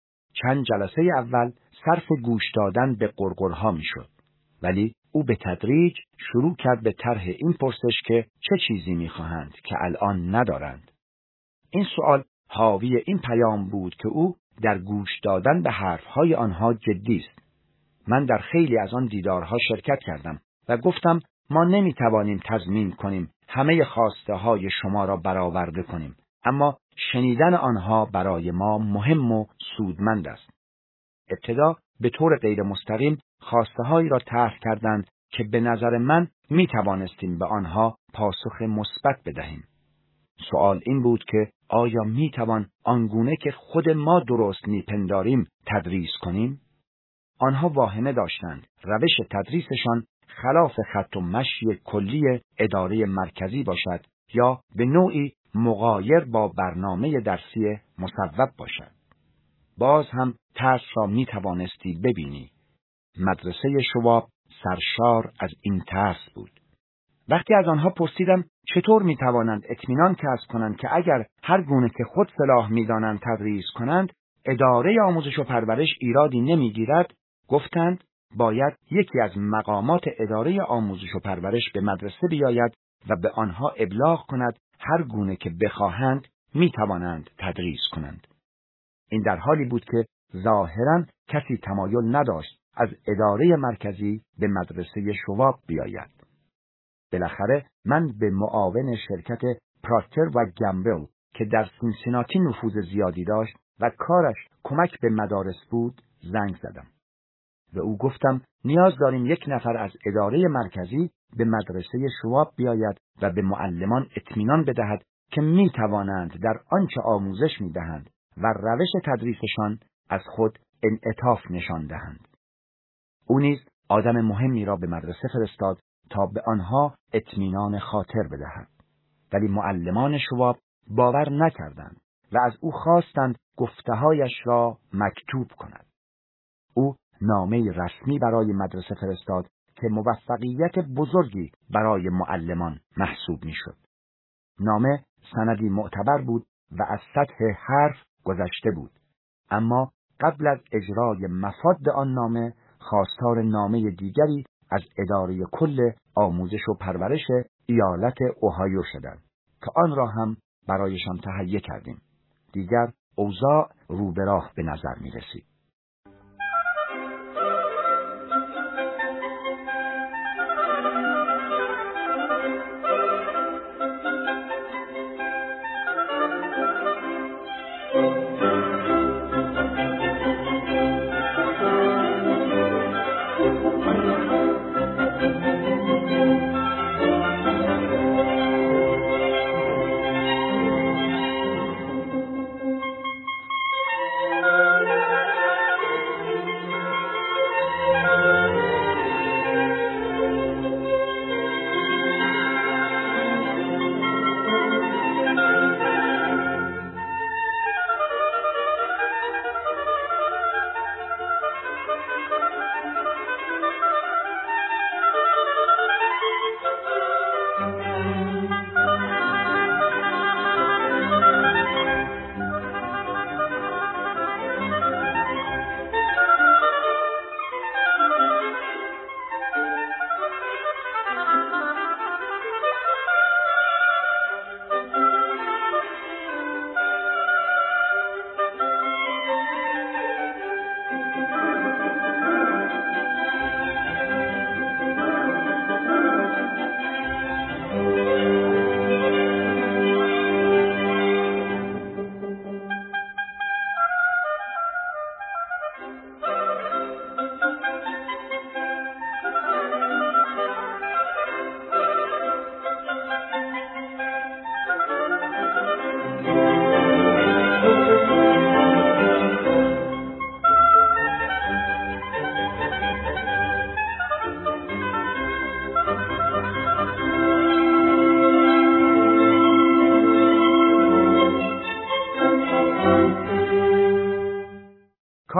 چند جلسه اول صرف گوش دادن به غرغرها می‌شد، ولی او به تدریج شروع کرد به طرح این پرسش که چه چیزی می‌خواهند که الان ندارند. این سوال حاوی این پیام بود که او در گوش دادن به حرفهای آنها جدی است. من در خیلی از آن دیدارها شرکت کردم و گفتم ما نمی‌توانیم تضمین کنیم همه خواسته های شما را برآورده کنیم، اما شنیدن آنها برای ما مهم و سودمند است. ابتدا به طور غیر مستقیم خواسته هایی را طرح کردند که به نظر من می توانستیم به آنها پاسخ مثبت بدهیم. سوال این بود که آیا می توان آنگونه که خود ما درست می پنداریم تدریس کنیم؟ آنها واهمه داشتند روش تدریسشان خلاف خط و مشی کلی اداره مرکزی باشد یا به نوعی مغایر با برنامه درسی مصوب باشد. باز هم ترس را می توانستی ببینی. مدرسه شواب سرشار از این ترس بود. وقتی از آنها پرسیدم چطور می توانند اطمینان کسب کنند که اگر هر گونه که خود صلاح می دانند تدریس کنند، اداره آموزش و پرورش ایرادی نمی گیرد، گفتند باید یکی از مقامات اداره آموزش و پرورش به مدرسه بیاید و به آنها ابلاغ کند هر گونه که بخواهند می توانند تدریس کنند. این در حالی بود که ظاهراً کسی تمایل نداشت از اداره مرکزی به مدرسه شواب بیاید. بالاخره من به معاون شرکت پراکتر و گمبل که در سینسیناتی نفوذ زیادی داشت و کارش کمک به مدارس بود زنگ زدم. و او گفتم نیاز داریم یک نفر از اداره مرکزی به مدرسه شواب بیاید و به معلمان اطمینان بدهد که می توانند در آنچه آموزش می دهند و روش تدریسشان از خود انعطاف نشان دهند. او نیز آدم مهمی را به مدرسه فرستاد تا به آنها اطمینان خاطر بدهد. ولی معلمان شواب باور نکردند و از او خواستند گفته‌هایش را مکتوب کند. او نامه رسمی برای مدرسه فرستاد که موفقیت بزرگی برای معلمان محسوب می‌شد. نامه سندی معتبر بود و از سطح حرف گذشته بود، اما قبل از اجرای مفاد آن نامه خواستار نامه دیگری از اداره کل آموزش و پرورش ایالت اوهایو شدند که آن را هم برایشان تهیه کردیم. دیگر اوضاع رو به راه به نظر می رسید.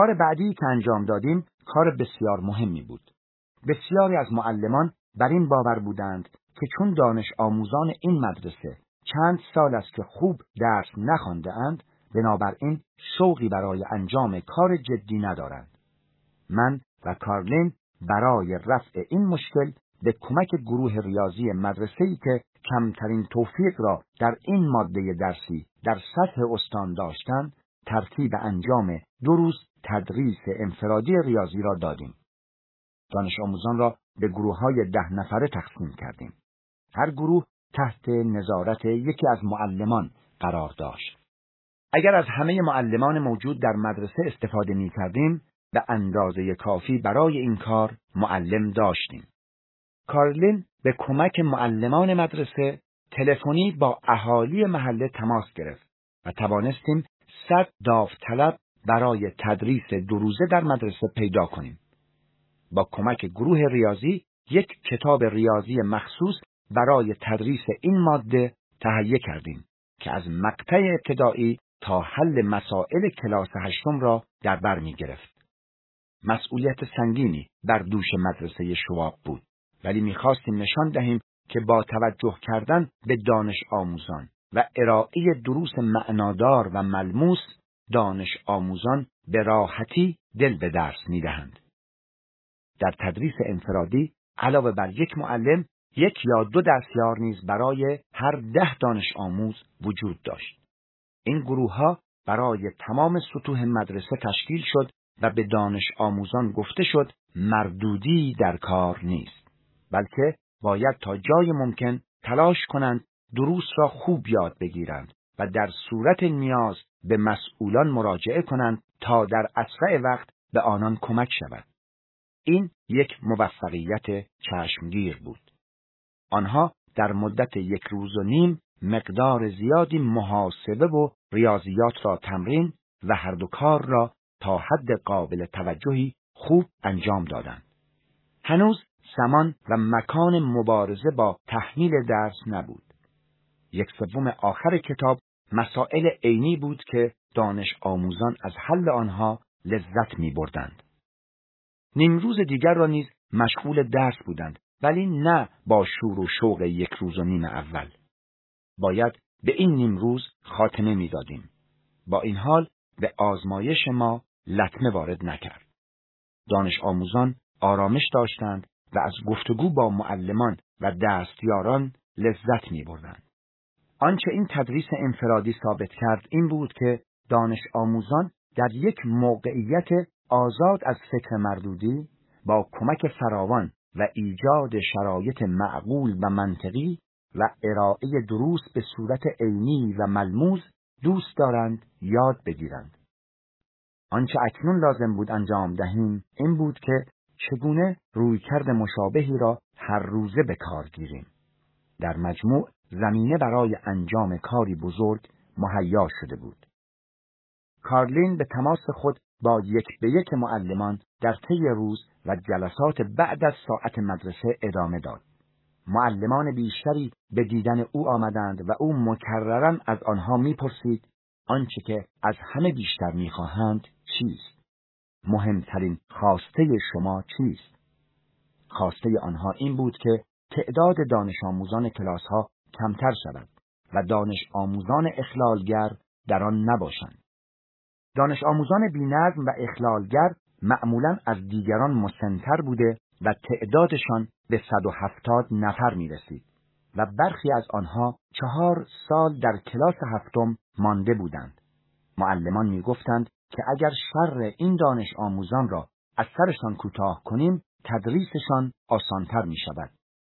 کار بعدی که انجام دادیم کار بسیار مهمی بود. بسیاری از معلمان بر این باور بودند که چون دانش آموزان این مدرسه چند سال است که خوب درس نخوانده اند، بنابراین شوقی برای انجام کار جدی ندارند. من و کارلین برای رفع این مشکل به کمک گروه ریاضی مدرسه‌ای که کمترین توفیق را در این ماده درسی در سطح استان داشتند، ترتیب انجام دو روز تدریس انفرادی ریاضی را دادیم. دانش آموزان را به گروه‌های ده نفره تقسیم کردیم. هر گروه تحت نظارت یکی از معلمان قرار داشت. اگر از همه معلمان موجود در مدرسه استفاده می کردیم، به اندازه کافی برای این کار معلم داشتیم. کارلین به کمک معلمان مدرسه تلفنی با اهالی محله تماس گرفت و توانستیم صد داوطلب برای تدریس دو روزه در مدرسه پیدا کنیم. با کمک گروه ریاضی یک کتاب ریاضی مخصوص برای تدریس این ماده تهیه کردیم که از مقطع ابتدایی تا حل مسائل کلاس هشتم را در بر می گرفت. مسئولیت سنگینی بر دوش مدرسه شواب بود، ولی می خواستیم نشان دهیم که با توجه کردن به دانش آموزان و ارائه دروس معنادار و ملموس، دانش آموزان به راحتی دل به درس می دهند. در تدریس انفرادی علاوه بر یک معلم، یک یا دو دستیار نیز برای هر ده دانش آموز وجود داشت. این گروه ها برای تمام سطوح مدرسه تشکیل شد و به دانش آموزان گفته شد مردودی در کار نیست، بلکه باید تا جای ممکن تلاش کنند دروس را خوب یاد بگیرند و در صورت نیاز به مسئولان مراجعه کنند تا در اسرع وقت به آنان کمک شود. این یک موفقیت چشمگیر بود. آنها در مدت یک روز و نیم مقدار زیادی محاسبه و ریاضیات را تمرین و هر دو کار را تا حد قابل توجهی خوب انجام دادند. هنوز زمان و مکان مبارزه با تحمیل درس نبود. یک سوم آخر کتاب مسائل عینی بود که دانش آموزان از حل آنها لذت می بردند. نیم روز دیگر را نیز مشغول درس بودند، ولی نه با شور و شوق یک روز و نیم اول. باید به این نیم روز خاتمه می دادیم. با این حال به آزمایش ما لطمه وارد نکرد. دانش آموزان آرامش داشتند و از گفتگو با معلمان و دستیاران لذت می بردند. آنچه این تدریس انفرادی ثابت کرد این بود که دانش آموزان در یک موقعیت آزاد از فکر مردودی با کمک فراوان و ایجاد شرایط معقول و منطقی و ارائه دروس به صورت عینی و ملموس دوست دارند یاد بگیرند. آنچه اکنون لازم بود انجام دهیم این بود که چگونه رویکرد مشابهی را هر روزه به کار گیریم. در مجموع زمینه برای انجام کاری بزرگ مهیا شده بود. کارلین به تماس خود با یک به یک معلمان در طی روز و جلسات بعد از ساعت مدرسه ادامه داد. معلمان بیشتری به دیدن او آمدند و او مکرراً از آنها می‌پرسید آنچه که از همه بیشتر می‌خواهند چیست؟ مهمترین خواسته شما چیست؟ خواسته آنها این بود که تعداد دانش آموزان کلاس‌ها کمتر شود و دانش آموزان اخلالگر در آن نباشند. دانش آموزان بی‌نظم و اخلالگر معمولاً از دیگران مسن‌تر بوده و تعدادشان به صد و هفتاد نفر می رسید و برخی از آنها چهار سال در کلاس هفتم مانده بودند. معلمان می گفتند که اگر شر این دانش آموزان را از سرشان کوتاه کنیم تدریسشان آسانتر می شود.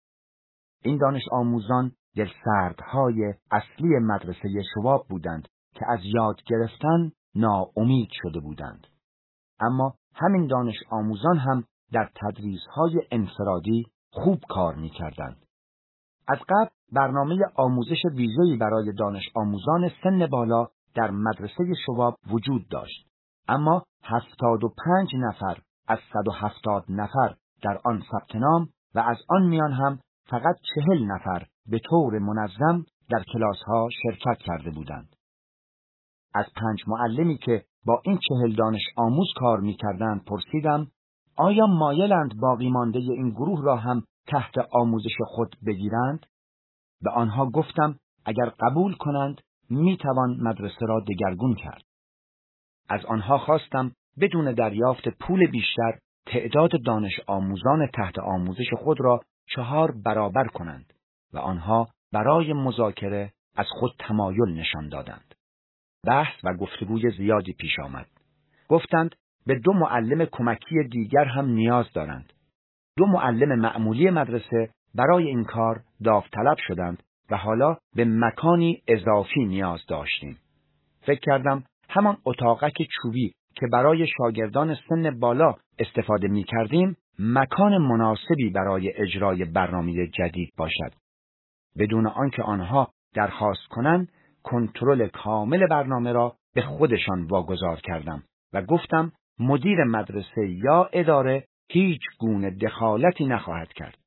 این دانش آموزان دلسردهای اصلی مدرسه شواب بودند که از یاد گرفتن ناامید شده بودند. اما همین دانش آموزان هم در تدریس‌های انفرادی خوب کار می‌کردند. از قبل برنامه آموزش ویژه‌ای برای دانش آموزان سن بالا در مدرسه شواب وجود داشت، اما هفتاد و پنج نفر از صد و هفتاد نفر در آن ثبت نام و از آن میان هم فقط چهل نفر به طور منظم در کلاس‌ها شرکت کرده بودند. از پنج معلمی که با این چهل دانش آموز کار می‌کردند پرسیدم آیا مایلند باقی مانده این گروه را هم تحت آموزش خود بگیرند؟ به آنها گفتم اگر قبول کنند میتوان مدرسه را دگرگون کرد. از آنها خواستم بدون دریافت پول بیشتر تعداد دانش آموزان تحت آموزش خود را چهار برابر کنند و آنها برای مذاکره از خود تمایل نشان دادند. بحث و گفتگوی زیادی پیش آمد. گفتند به دو معلم کمکی دیگر هم نیاز دارند. دو معلم معمولی مدرسه برای این کار داوطلب شدند و حالا به مکانی اضافی نیاز داشتیم. فکر کردم همان اتاقک چوبی که برای شاگردان سن بالا استفاده می کردیم مکان مناسبی برای اجرای برنامه جدید باشد. بدون آنکه آنها درخواست کنند کنترل کامل برنامه را به خودشان واگذار کردم و گفتم مدیر مدرسه یا اداره هیچ گونه دخالتی نخواهد کرد.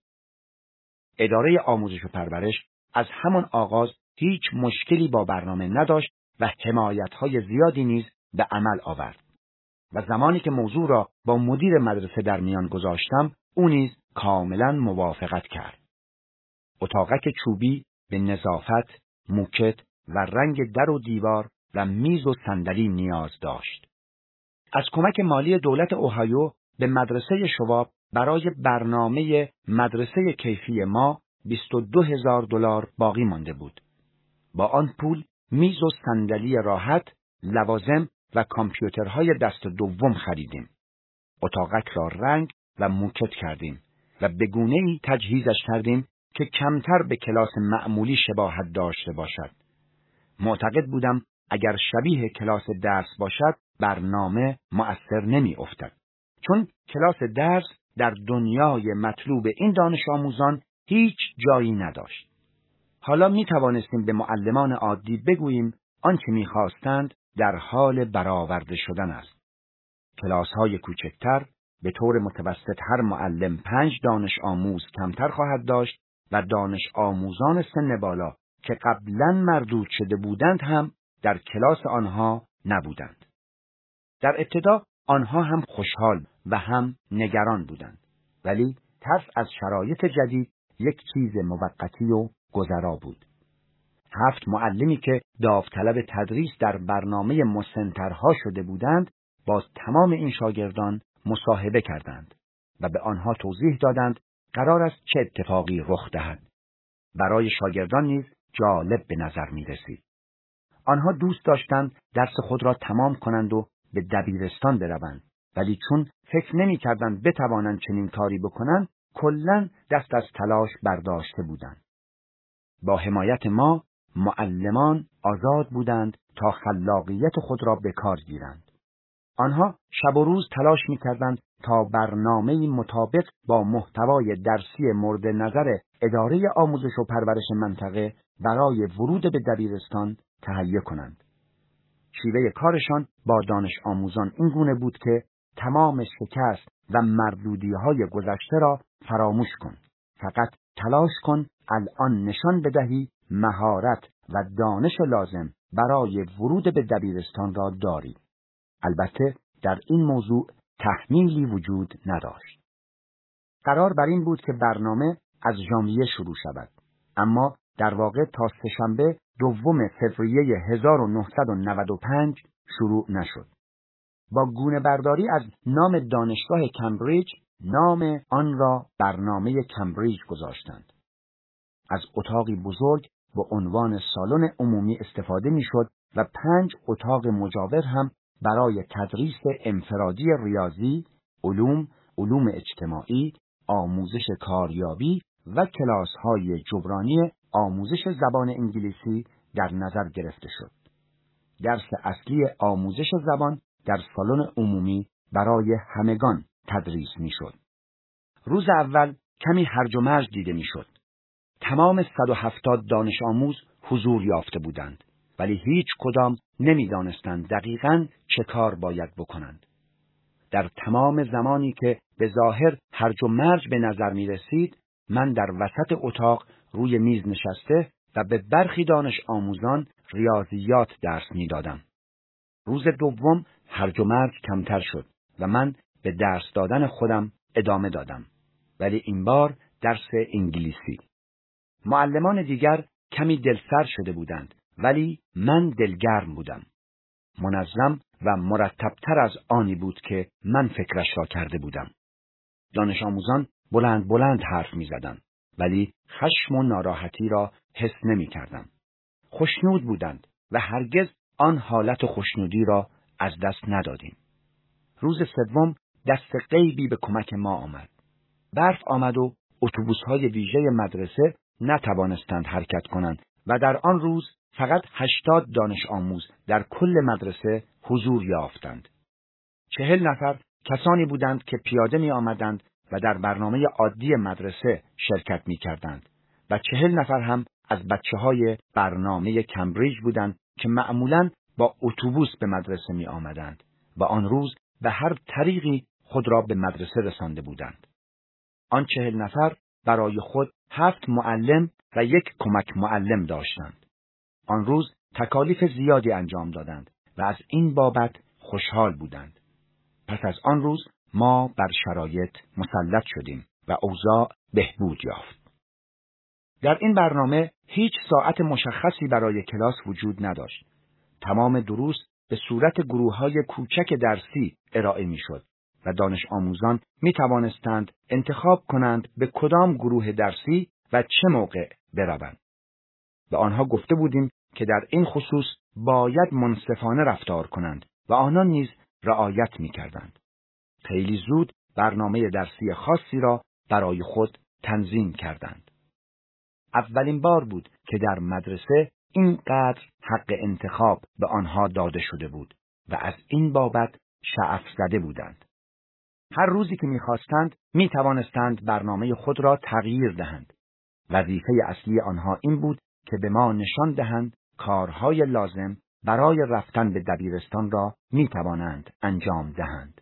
اداره آموزش و پرورش از همان آغاز هیچ مشکلی با برنامه نداشت و حمایت‌های زیادی نیز به عمل آورد. و زمانی که موضوع را با مدیر مدرسه در میان گذاشتم، او نیز کاملا موافقت کرد. اتاقک چوبی به نظافت، موکت و رنگ در و دیوار و میز و صندلی نیاز داشت. از کمک مالی دولت اوهایو به مدرسه شواب برای برنامه مدرسه کیفی ما بیست و دو هزار دلار باقی مانده بود. با آن پول میز و صندلی راحت، لوازم و کامپیوترهای دست دوم خریدیم. اتاقک را رنگ و موکت کردیم و به گونه‌ای تجهیزش کردیم که کمتر به کلاس معمولی شباهت داشته باشد. معتقد بودم اگر شبیه کلاس درس باشد برنامه مؤثر نمی افتد. چون کلاس درس در دنیای مطلوب این دانش آموزان هیچ جایی نداشت. حالا می توانستیم به معلمان عادی بگوییم آنچه می خواستند در حال برآورده شدن است. کلاس های کوچکتر به طور متوسط هر معلم پنج دانش آموز کمتر خواهد داشت و دانش آموزان سن بالا که قبلا مردود شده بودند هم در کلاس آنها نبودند. در ابتدا آنها هم خوشحال و هم نگران بودند، ولی ترس از شرایط جدید یک چیز موقتی و گذرا بود. هفت معلمی که داوطلب تدریس در برنامه مسنترها شده بودند با تمام این شاگردان مصاحبه کردند و به آنها توضیح دادند قرار است چه اتفاقی رخ دهد. برای شاگردان نیز جالب به نظر می رسید. آنها دوست داشتند درس خود را تمام کنند و به دبیرستان بروند، ولی چون فکر نمی کردند بتوانند چنین کاری بکنند، کلاً دست از تلاش برداشته بودند. با حمایت ما، معلمان آزاد بودند تا خلاقیت خود را به کار گیرند. آنها شب و روز تلاش می کردند تا برنامه‌ای مطابق با محتوای درسی مورد نظر اداره آموزش و پرورش منطقه برای ورود به دبیرستان تهیه کنند. شیوه کارشان با دانش آموزان این گونه بود که تمام شکست و مردودی‌های گذشته را فراموش کن. فقط تلاش کن الان نشان بدهی مهارت و دانش لازم برای ورود به دبیرستان را داری. البته در این موضوع تحمیلی وجود نداشت. قرار بر این بود که برنامه از ژانویه شروع شود، اما در واقع تا سه‌شنبه دوم فوریه هزار و نهصد و نود و پنج شروع نشد. با گونه برداری از نام دانشگاه کمبریج، نام آن را برنامه کمبریج گذاشتند. از اتاقی بزرگ با عنوان سالن عمومی استفاده می‌شد و پنج اتاق مجاور هم برای تدریس انفرادی ریاضی، علوم، علوم اجتماعی، آموزش کاریابی و کلاس‌های جبرانی آموزش زبان انگلیسی در نظر گرفته شد. درس اصلی آموزش زبان در سالن عمومی برای همگان تدریس می‌شد. روز اول کمی هرج و مرج دیده می‌شد. تمام صد و هفتاد دانش آموز حضور یافته بودند، ولی هیچ کدام نمی‌دانستند دقیقاً چه کار باید بکنند. در تمام زمانی که به ظاهر هرج و مرج به نظر می رسید، من در وسط اتاق روی میز نشسته و به برخی دانش آموزان ریاضیات درس می دادم. روز دوم هرج و مرج کمتر شد و من به درس دادن خودم ادامه دادم، ولی این بار درس انگلیسی. معلمان دیگر کمی دلسر شده بودند، ولی من دلگرم بودم. منظم و مرتبتر از آنی بود که من فکرش را کرده بودم. دانش آموزان بلند بلند حرف می زدند، ولی خشم و ناراحتی را حس نمی کردم. خوشنود بودند و هرگز آن حالت خوشنودی را از دست ندادیم. روز سوم دست غیبی به کمک ما آمد. برف آمد و اتوبوس‌های ویژه مدرسه نتوانستند حرکت کنند و در آن روز فقط هشتاد دانش آموز در کل مدرسه حضور یافتند. چهل نفر کسانی بودند که پیاده می آمدند و در برنامه عادی مدرسه شرکت می کردند و چهل نفر هم از بچه‌های برنامه کمبریج بودند که معمولاً با اتوبوس به مدرسه می آمدند و آن روز به هر طریقی خود را به مدرسه رسانده بودند. آن چهل نفر برای خود هفت معلم و یک کمک معلم داشتند. آن روز تکالیف زیادی انجام دادند و از این بابت خوشحال بودند. پس از آن روز ما بر شرایط مسلط شدیم و اوضاع بهبود یافت. در این برنامه هیچ ساعت مشخصی برای کلاس وجود نداشت. تمام دروس به صورت گروه‌های کوچک درسی ارائه می‌شد و دانش آموزان می توانستند انتخاب کنند به کدام گروه درسی و چه موقع بروند. به آنها گفته بودیم که در این خصوص باید منصفانه رفتار کنند و آنها نیز رعایت می کردند. خیلی زود برنامه درسی خاصی را برای خود تنظیم کردند. اولین بار بود که در مدرسه اینقدر حق انتخاب به آنها داده شده بود و از این بابت شعف زده بودند. هر روزی که می‌خواستند می‌توانستند برنامه خود را تغییر دهند. وظیفه اصلی آنها این بود که به ما نشان دهند کارهای لازم برای رفتن به دبیرستان را می‌توانند انجام دهند.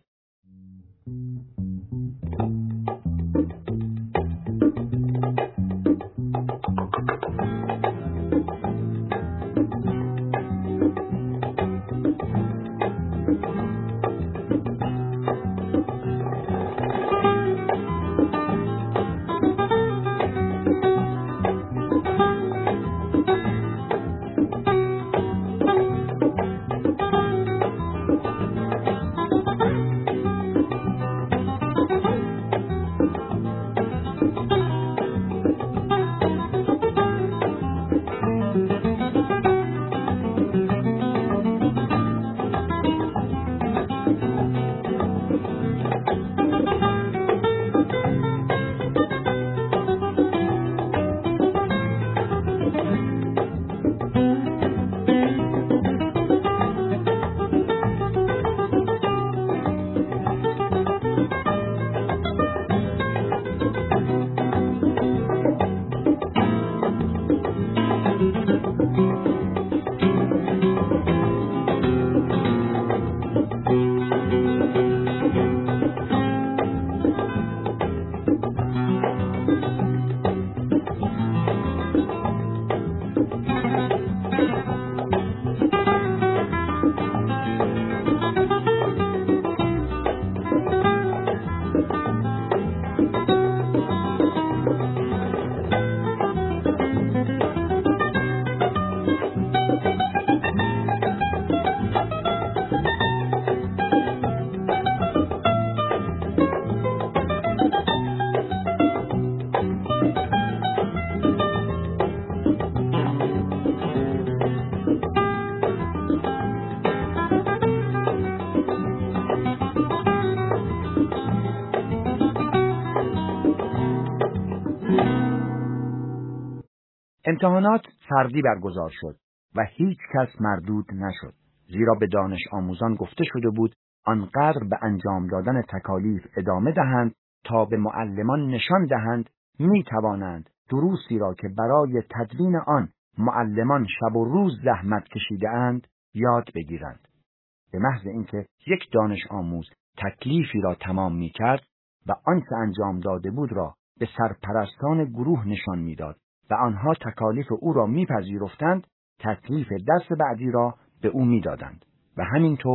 امتحانات فردی برگزار شد و هیچ کس مردود نشد، زیرا به دانش آموزان گفته شده بود آنقدر به انجام دادن تکالیف ادامه دهند تا به معلمان نشان دهند می توانند دروسی را که برای تدوین آن معلمان شب و روز زحمت کشیده اند یاد بگیرند. به محض اینکه یک دانش آموز تکلیفی را تمام می کرد و آنچه انجام داده بود را به سرپرستان گروه نشان می داد و آنها تکالیف او را میپذیرفتند، تکلیف درس بعدی را به او میدادند و همینطور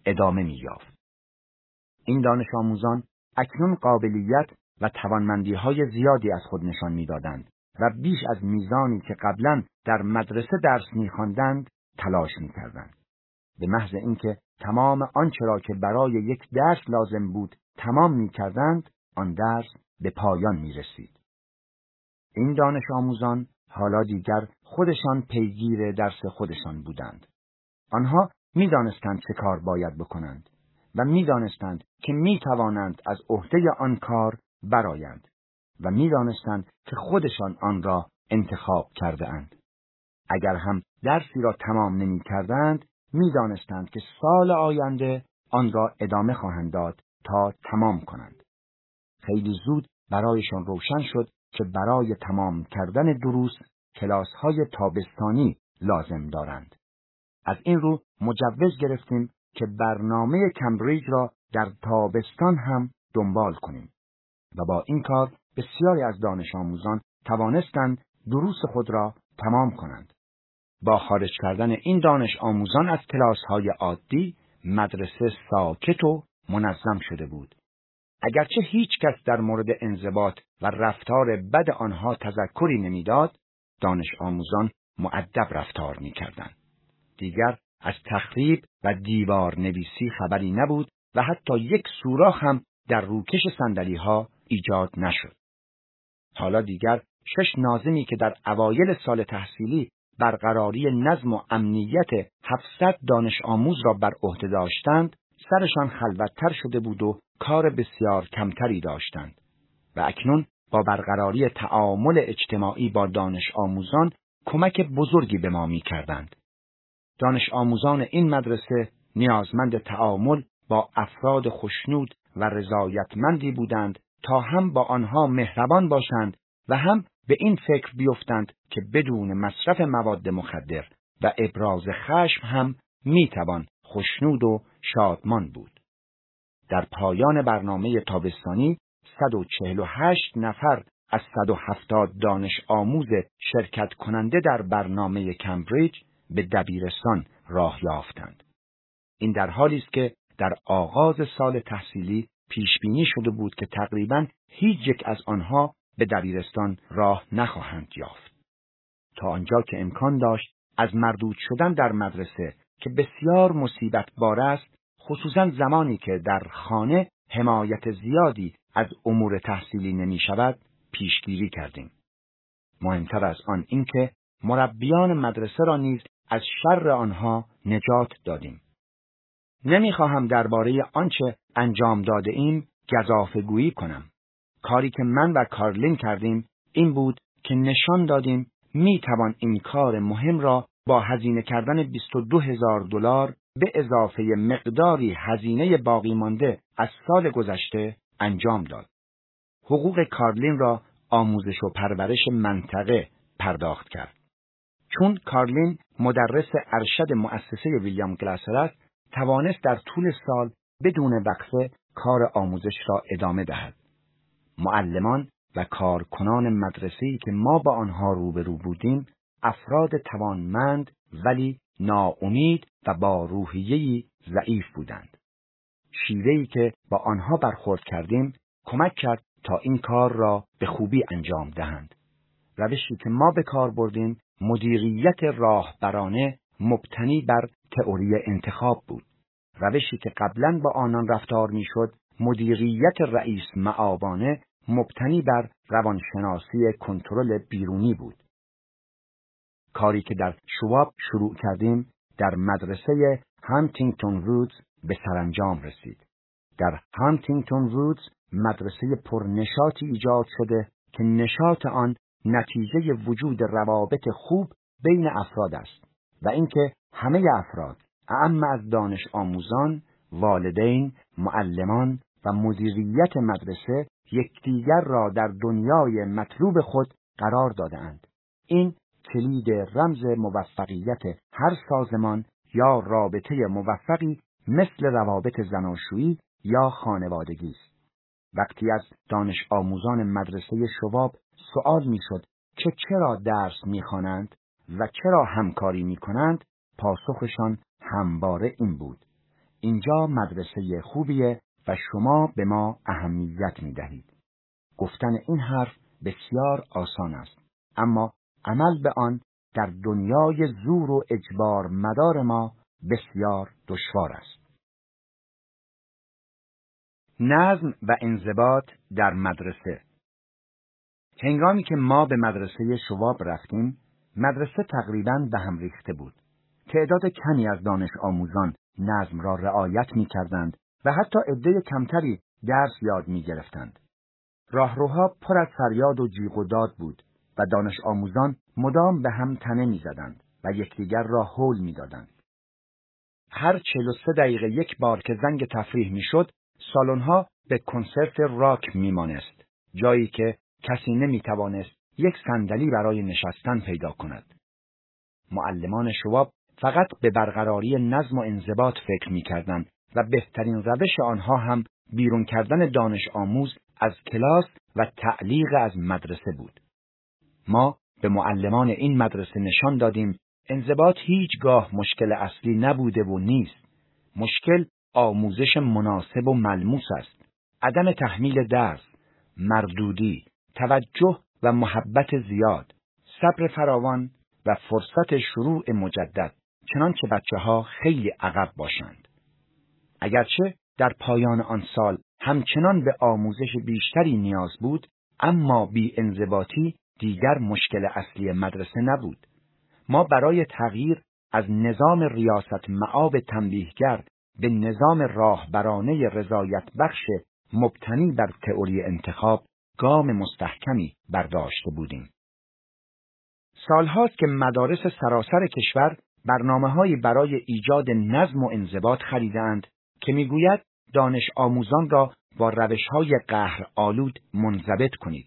ادامه می‌یافت. این دانش آموزان اکنون قابلیت و توانمندی‌های زیادی از خود نشان می‌دادند و بیش از میزانی که قبلا در مدرسه درس می‌خواندند تلاش می‌کردند. به محض اینکه تمام آنچه را که برای یک درس لازم بود تمام می‌کردند، آن درس به پایان می‌رسید. این دانش آموزان حالا دیگر خودشان پیگیر درس خودشان بودند. آنها می‌دانستند چه کار باید بکنند و می‌دانستند که می‌توانند از عهده آن کار برآیند و می‌دانستند که خودشان آن را انتخاب کرده اند. اگر هم درسی را تمام نمی‌کردند، می‌دانستند که سال آینده آن را ادامه خواهند داد تا تمام کنند. خیلی زود برایشان روشن شد که برای تمام کردن دروس کلاس‌های تابستانی لازم دارند. از این رو مجوز گرفتیم که برنامه کمبریج را در تابستان هم دنبال کنیم و با این کار بسیاری از دانش آموزان توانستند دروس خود را تمام کنند. با خارج کردن این دانش آموزان از کلاس‌های عادی، مدرسه ساکت و منظم شده بود. اگرچه هیچ کس در مورد انضباط و رفتار بد آنها تذکری نمیداد، دانش آموزان مؤدب رفتار می‌کردند. دیگر از تخریب و دیوار نویسی خبری نبود و حتی یک سوراخ هم در روکش صندلی‌ها ایجاد نشد. حالا دیگر شش ناظمی که در اوایل سال تحصیلی برقراری نظم و امنیت هفتصد دانش آموز را بر عهده داشتند، سرشان خلوت‌تر شده بود و کار بسیار کمتری داشتند و اکنون با برقراری تعامل اجتماعی با دانش آموزان کمک بزرگی به ما می‌کردند. دانش آموزان این مدرسه نیازمند تعامل با افراد خوشنود و رضایتمندی بودند تا هم با آنها مهربان باشند و هم به این فکر بیفتند که بدون مصرف مواد مخدر و ابراز خشم هم میتوان خوشنود و شادمان بود. در پایان برنامه تابستانی صد و چهل و هشت نفر از صد و هفتاد دانش آموز شرکت کننده در برنامه کمبریج به دبیرستان راه یافتند. این در حالی است که در آغاز سال تحصیلی پیش بینی شده بود که تقریباً هیچ یک از آنها به دبیرستان راه نخواهند یافت. تا آنجا که امکان داشت از مردود شدن در مدرسه که بسیار مصیبت بار است، خصوصاً زمانی که در خانه حمایت زیادی از امور تحصیلی نمی شود، پیشگیری کردیم. مهمتر از آن این که مربیان مدرسه را نیز از شر آنها نجات دادیم. نمیخواهم درباره آنچه انجام داده ایم گزافه‌گویی کنم. کاری که من و کارلین کردیم این بود که نشان دادیم میتوان این کار مهم را با هزینه کردن بیست و دو هزار دلار به اضافه مقداری هزینه باقی مانده از سال گذشته انجام داد. حقوق کارلین را آموزش و پرورش منطقه پرداخت کرد. چون کارلین مدرس ارشد مؤسسه ویلیام گلاسر است، توانست در طول سال بدون وقفه کار آموزش را ادامه دهد. معلمان و کارکنان مدرسه‌ای که ما با آنها روبرو بودیم، افراد توانمند ولی ناامید و با روحیه‌ای ضعیف بودند. شیوه‌ای که با آنها برخورد کردیم کمک کرد تا این کار را به خوبی انجام دهند. روشی که ما به کار بردیم مدیریت راهبرانه مبتنی بر تئوری انتخاب بود. روشی که قبلاً با آنان رفتار می‌شد مدیریت رئیس معابانه مبتنی بر روانشناسی کنترل بیرونی بود. کاری که در شواب شروع کردیم در مدرسه هانتینگتون وودز به سرانجام رسید. در هانتینگتون وودز مدرسه پرنشاطی ایجاد شده که نشاط آن نتیجه وجود روابط خوب بین افراد است و اینکه همه افراد، اعم از دانش آموزان، والدین، معلمان و مدیریت مدرسه یکدیگر را در دنیای مطلوب خود قرار داده‌اند. این کلید رمز موفقیت هر سازمان یا رابطه موفقی مثل روابط زناشویی یا خانوادگی است. وقتی از دانش آموزان مدرسه شواب سوال می‌شد که چرا درس می‌خوانند و چرا همکاری می‌کنند، پاسخشان همواره این بود: اینجا مدرسه خوبیه و شما به ما اهمیت می دهید. گفتن این حرف بسیار آسان است، اما عمل به آن در دنیای زور و اجبار مدار ما بسیار دشوار است. نظم و انضباط در مدرسه. هنگامی که ما به مدرسه شواب رفتیم، مدرسه تقریباً به هم ریخته بود. تعداد کمی از دانش آموزان نظم را رعایت می کردند و حتی عده کمتری درس یاد می گرفتند. راهروها پر از فریاد و جیغ و داد بود و دانش آموزان مدام به هم تنه می زدند و یکدیگر را هول می دادند. هر چهل و سه دقیقه یک بار که زنگ تفریح می شد، سالن‌ها به کنسرت راک می مانست، جایی که کسی نمی توانست یک صندلی برای نشستن پیدا کند. معلمان شواب فقط به برقراری نظم و انضباط فکر می کردند و بهترین روش آنها هم بیرون کردن دانش آموز از کلاس و تعلیق از مدرسه بود. ما به معلمان این مدرسه نشان دادیم انضباط هیچگاه مشکل اصلی نبوده و نیست. مشکل آموزش مناسب و ملموس است. عدم تحمیل درس، مردودی، توجه و محبت زیاد، صبر فراوان و فرصت شروع مجدد، چنانچه بچه‌ها خیلی عقب باشند. اگرچه در پایان آن سال همچنان به آموزش بیشتری نیاز بود، اما بی انضباطی دیگر مشکل اصلی مدرسه نبود. ما برای تغییر از نظام ریاست مآب تنبیهگر به نظام راهبرانه رضایت بخش مبتنی بر تئوری انتخاب گام مستحکمی برداشته بودیم. سالهاست که مدارس سراسر کشور برنامه‌هایی برای ایجاد نظم و انضباط خریدند که میگوید دانش آموزان را با روش‌های قهر آلود منضبط کنید.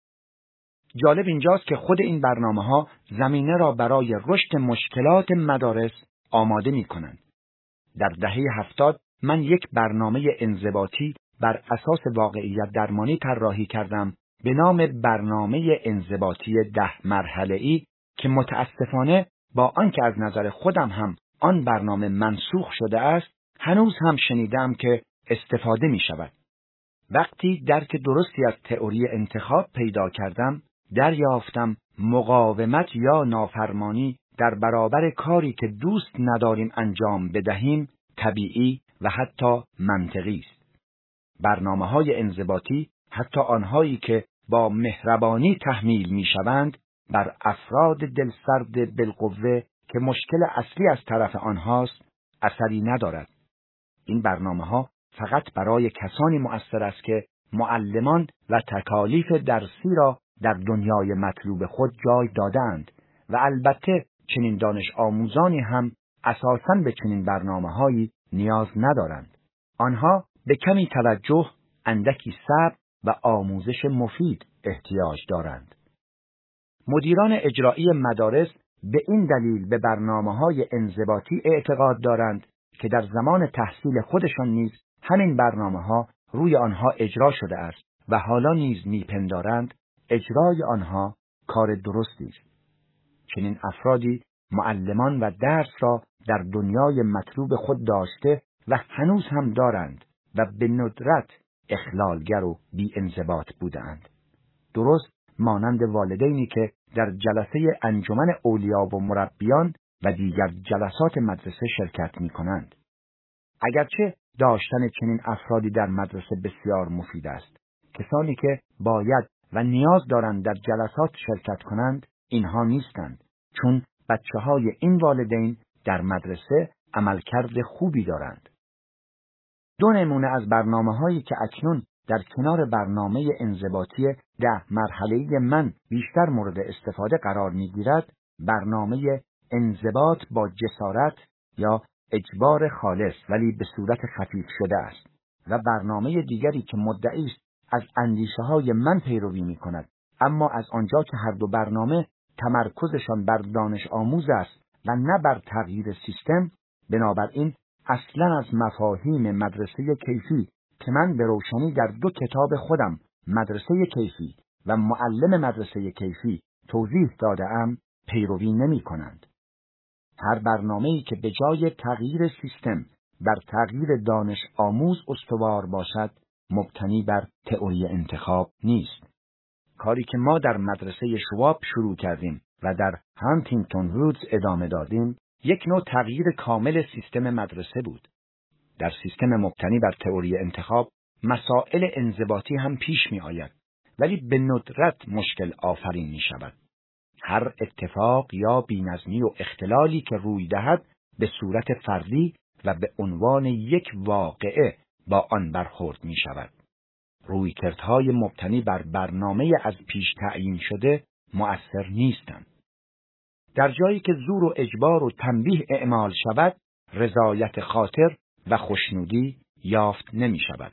جالب اینجاست که خود این برنامه‌ها زمینه را برای رشد مشکلات مدارس آماده می‌کنند. در دهه هفتاد من یک برنامه انضباطی بر اساس واقعیت درمانی طراحی کردم به نام برنامه انضباطی ده مرحله‌ای که متاسفانه با آنکه از نظر خودم هم آن برنامه منسوخ شده است، هنوز هم شنیدم که استفاده می شود. وقتی درک درستی از تئوری انتخاب پیدا کردم، دریافتم مقاومت یا نافرمانی در برابر کاری که دوست نداریم انجام بدهیم طبیعی و حتی منطقی است. برنامه‌های انضباطی، حتی آنهایی که با مهربانی تحمیل می‌شوند، بر افراد دلسرد بالقوه که مشکل اصلی از طرف آنهاست اثری ندارد. این برنامه‌ها فقط برای کسانی مؤثر است که معلمان و تکالیف درسی را در دنیای مطلوب خود جای دادند و البته چنین دانش آموزانی هم اساساً به چنین برنامه‌هایی نیاز ندارند. آنها به کمی توجه، اندکی صبر و آموزش مفید احتیاج دارند. مدیران اجرایی مدارس به این دلیل به برنامه‌های انضباطی اعتقاد دارند که در زمان تحصیل خودشان نیز همین برنامه‌ها روی آنها اجرا شده است و حالا نیز میپندارند اجرای آنها کار درستی است. چنین افرادی معلمان و درس را در دنیای مطلوب خود داشته و هنوز هم دارند و به ندرت اخلالگر و بی انضباط بودند. درست مانند والدینی که در جلسه انجمن اولیا و مربیان و دیگر جلسات مدرسه شرکت می کنند. اگرچه داشتن چنین افرادی در مدرسه بسیار مفید است، کسانی که باید و نیاز دارند در جلسات شرکت کنند اینها نیستند، چون بچه های این والدین در مدرسه عملکرد خوبی دارند. دو نمونه از برنامه هایی که اکنون در کنار برنامه انضباطی ده مرحله‌ای من بیشتر مورد استفاده قرار می‌گیرد، برنامه انضباط با جسارت یا اجبار خالص ولی به صورت خفیف شده است و برنامه دیگری که مدعی است از اندیشه‌های من پیروی می‌کند، اما از آنجا که هر دو برنامه تمرکزشان بر دانش آموز است و نه بر تغییر سیستم، بنابراین اصلا از مفاهیم مدرسه کیفی که من به روشنی در دو کتاب خودم مدرسه کیفی و معلم مدرسه کیفی توضیح داده‌ام پیروی نمی کنند. هر برنامه‌ای که به جای تغییر سیستم بر تغییر دانش آموز استوار باشد، مبتنی بر تئوری انتخاب نیست. کاری که ما در مدرسه شواب شروع کردیم و در هانتینگتون وودز ادامه دادیم، یک نوع تغییر کامل سیستم مدرسه بود. در سیستم مبتنی بر تئوری انتخاب، مسائل انضباطی هم پیش می آید، ولی به ندرت مشکل آفرین می شود. هر اتفاق یا بی‌نظمی و اختلالی که روی دهد به صورت فردی و به عنوان یک واقعه با آن برخورد می شود. رویکردهای مبتنی بر برنامه از پیش تعیین شده مؤثر نیستند. در جایی که زور و اجبار و تنبیه اعمال شود، رضایت خاطر و خوشنودی یافت نمی شود.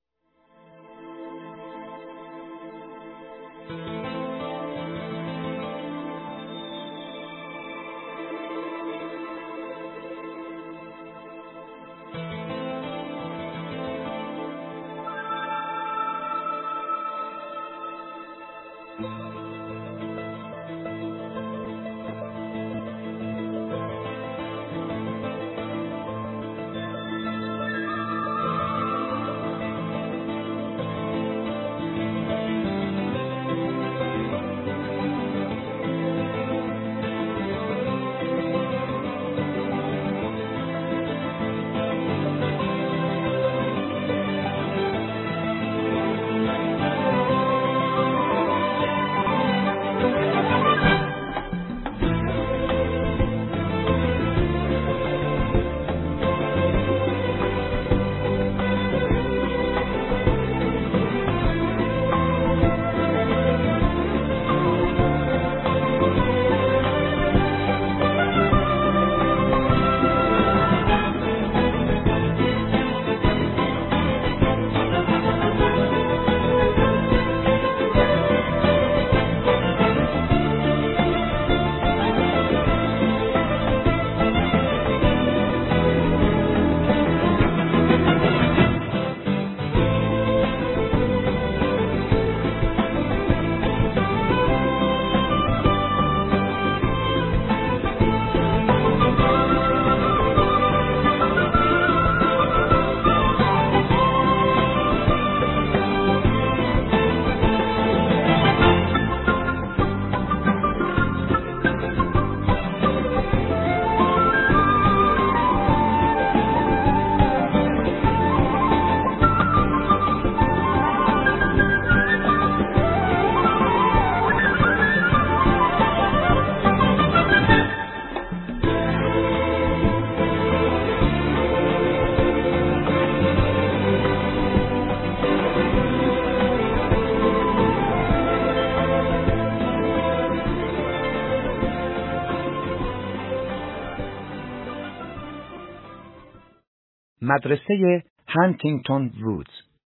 مدرسه هانتینگتون وودز.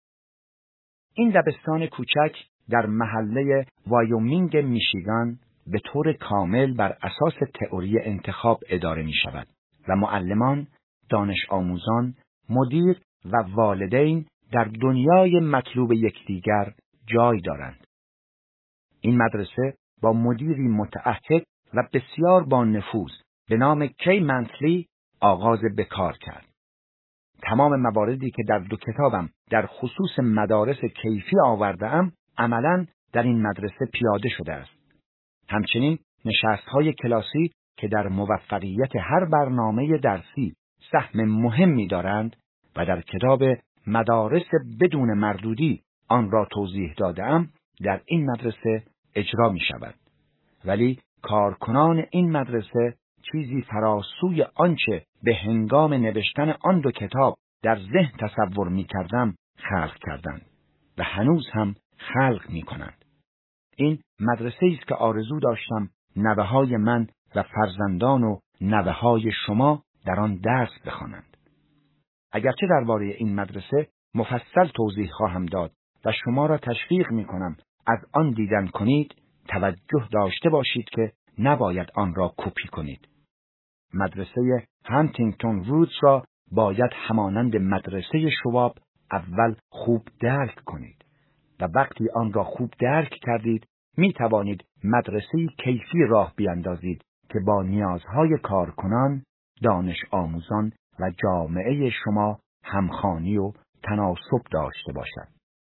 این دبستان کوچک در محله وایومینگ میشیگان به طور کامل بر اساس تئوری انتخاب اداره می شود و معلمان، دانش آموزان، مدیر و والدین در دنیای مطلوب یکدیگر جای دارند. این مدرسه با مدیری متعهد و بسیار با نفوذ به نام کی منتلی آغاز به کار کرد. تمام مواردی که در دو کتابم در خصوص مدارس کیفی آورده‌ام عملاً در این مدرسه پیاده شده است. همچنین نشست‌های کلاسی که در موفقیت هر برنامه درسی سهم مهمی دارند و در کتاب مدارس بدون مردودی آن را توضیح داده‌ام در این مدرسه اجرا می شود. ولی کارکنان این مدرسه چیزی فراسوی آنچه به هنگام نوشتن آن دو کتاب در ذهن تصور می کردم خلق کردند و هنوز هم خلق می کنند. این مدرسه است که آرزو داشتم نوه‌های من و فرزندان و نوه‌های شما در آن درس بخوانند. اگرچه درباره این مدرسه مفصل توضیح خواهم داد و شما را تشویق می کنم از آن دیدن کنید، توجه داشته باشید که نباید آن را کپی کنید. مدرسه هانتینگتون وودز را باید همانند مدرسه شواب اول خوب درک کنید و وقتی آن را خوب درک کردید می توانید مدرسه کیفی راه بیاندازید که با نیازهای کارکنان، دانش آموزان و جامعه شما همخوانی و تناسب داشته باشد.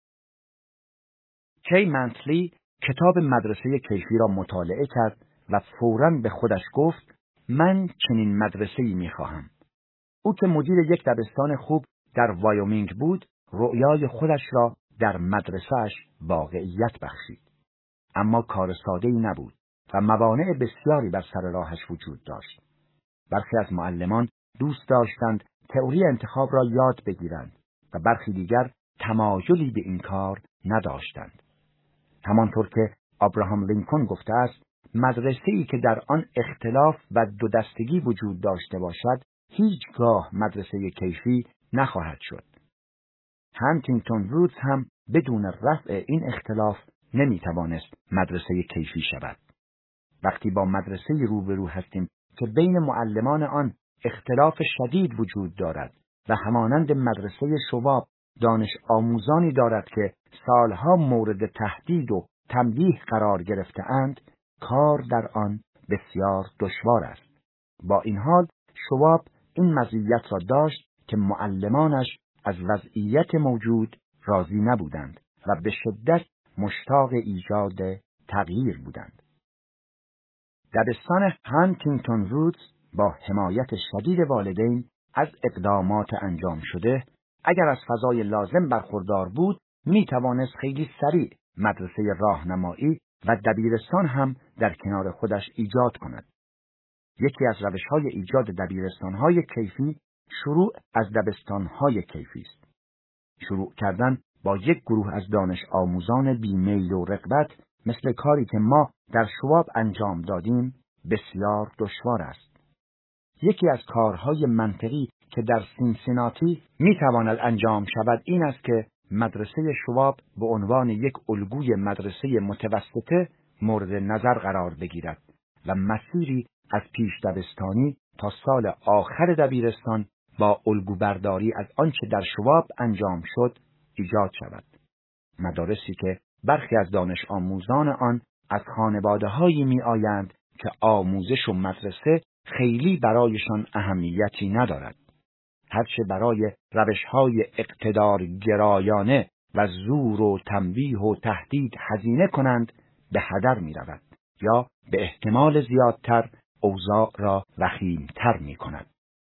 کی منتلی کتاب مدرسه کیفی را مطالعه کرد و فوراً به خودش گفت من چنین مدرسه‌ای می‌خواهم. او که مدیر یک دبستان خوب در وایومینگ بود، رؤیای خودش را در مدرسه‌اش واقعیت بخشید. اما کار ساده‌ای نبود و موانع بسیاری بر سر راهش وجود داشت. برخی از معلمان دوست داشتند تئوری انتخاب را یاد بگیرند و برخی دیگر تمایلی به این کار نداشتند. همانطور که ابراهام لینکلن گفته است، مدرسه‌ای که در آن اختلاف و دو دستگی وجود داشته باشد، هیچگاه مدرسه کیفی نخواهد شد. هانتینگتون وودز هم بدون رفع این اختلاف نمیتوانست مدرسه کیفی شود. وقتی با مدرسه روبرو هستیم که بین معلمان آن اختلاف شدید وجود دارد و همانند مدرسه شواب دانش آموزانی دارد که سالها مورد تهدید و تنبیه قرار گرفته اند، کار در آن بسیار دشوار است. با این حال شواب این مزیت را داشت که معلمانش از وضعیت موجود راضی نبودند و به شدت مشتاق ایجاد تغییر بودند. دبستان هانتینگتون وودز با حمایت شدید والدین از اقدامات انجام شده، اگر از فضای لازم برخوردار بود، می توانست خیلی سریع مدرسه راهنمایی و دبیرستان هم در کنار خودش ایجاد کند. یکی از روش‌های ایجاد دبیرستان‌های کیفی شروع از دبستان‌های کیفی است. شروع کردن با یک گروه از دانش آموزان بیمیل و رغبت مثل کاری که ما در شواب انجام دادیم بسیار دشوار است. یکی از کارهای منطقی که در سینسیناتی میتواند انجام شود این است که مدرسه شواب به عنوان یک الگوی مدرسه متوسطه مورد نظر قرار بگیرد و مسیری از پیش دبستانی تا سال آخر دبیرستان با الگو برداری از آنچه در شواب انجام شد ایجاد شود. مدارسی که برخی از دانش آموزان آن از خانواده‌هایی می آیند که آموزش و مدرسه خیلی برایشان اهمیتی ندارد. هرچه برای روش‌های اقتدارگرایانه و زور و تنبیه و تهدید هزینه کنند به هدر می رود یا به احتمال زیادتر اوضاع را وخیم‌تر می کند.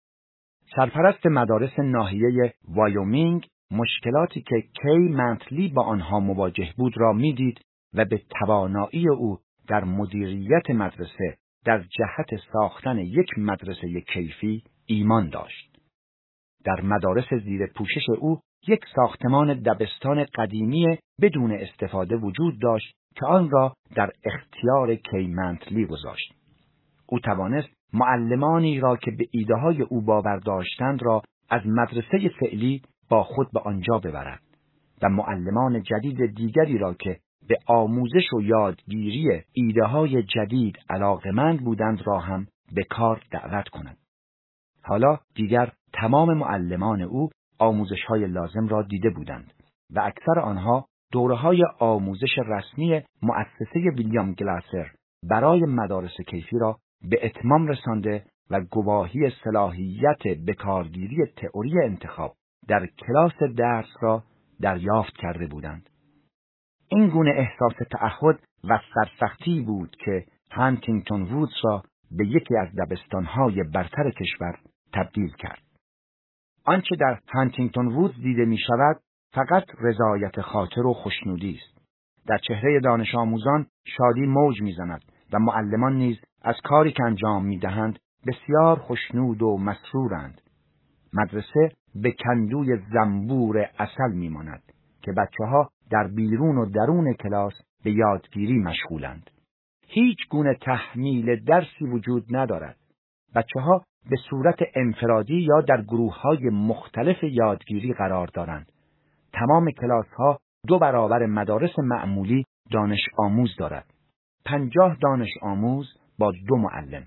سرپرست مدارس ناحیه وایومینگ مشکلاتی که کی منتلی با آنها مواجه بود را میدید و به توانایی او در مدیریت مدرسه در جهت ساختن یک مدرسه کیفی ایمان داشت. در مدارس زیر پوشش او یک ساختمان دبستان قدیمی بدون استفاده وجود داشت که آن را در اختیار کی منتلی گذاشت. او توانست معلمانی را که به ایده‌های او باور داشتند را از مدرسه فعلی با خود به آنجا ببرد و معلمان جدید دیگری را که به آموزش و یادگیری ایده‌های جدید علاقه‌مند بودند را هم به کار دعوت کند. حالا دیگر تمام معلمان او آموزش‌های لازم را دیده بودند و اکثر آنها دوره‌های آموزش رسمی مؤسسه ویلیام گلاسر برای مدارس کیفی را به اتمام رسانده و گواهی صلاحیت بکارگیری تئوری انتخاب در کلاس درس را دریافت کرده بودند. این گونه احساس تعهد و سرسختی بود که هانتینگتون وودز را به یکی از دبستان‌های برتر کشور تبدیل کرد. آنچه در هانتینگتون وودز دیده می شود فقط رضایت خاطر و خوشنودی است. در چهره دانش آموزان شادی موج می زند و معلمان نیز از کاری که انجام می دهند بسیار خوشنود و مسرورند. مدرسه به کندوی زنبور عسل می ماند که بچه ها در بیرون و درون کلاس به یادگیری مشغولند. هیچ گونه تحمیل درسی وجود ندارد. بچه ها به صورت انفرادی یا در گروه های مختلف یادگیری قرار دارند. تمام کلاس ها دو برابر مدارس معمولی دانش آموز دارد. پنجاه دانش آموز با دو معلم.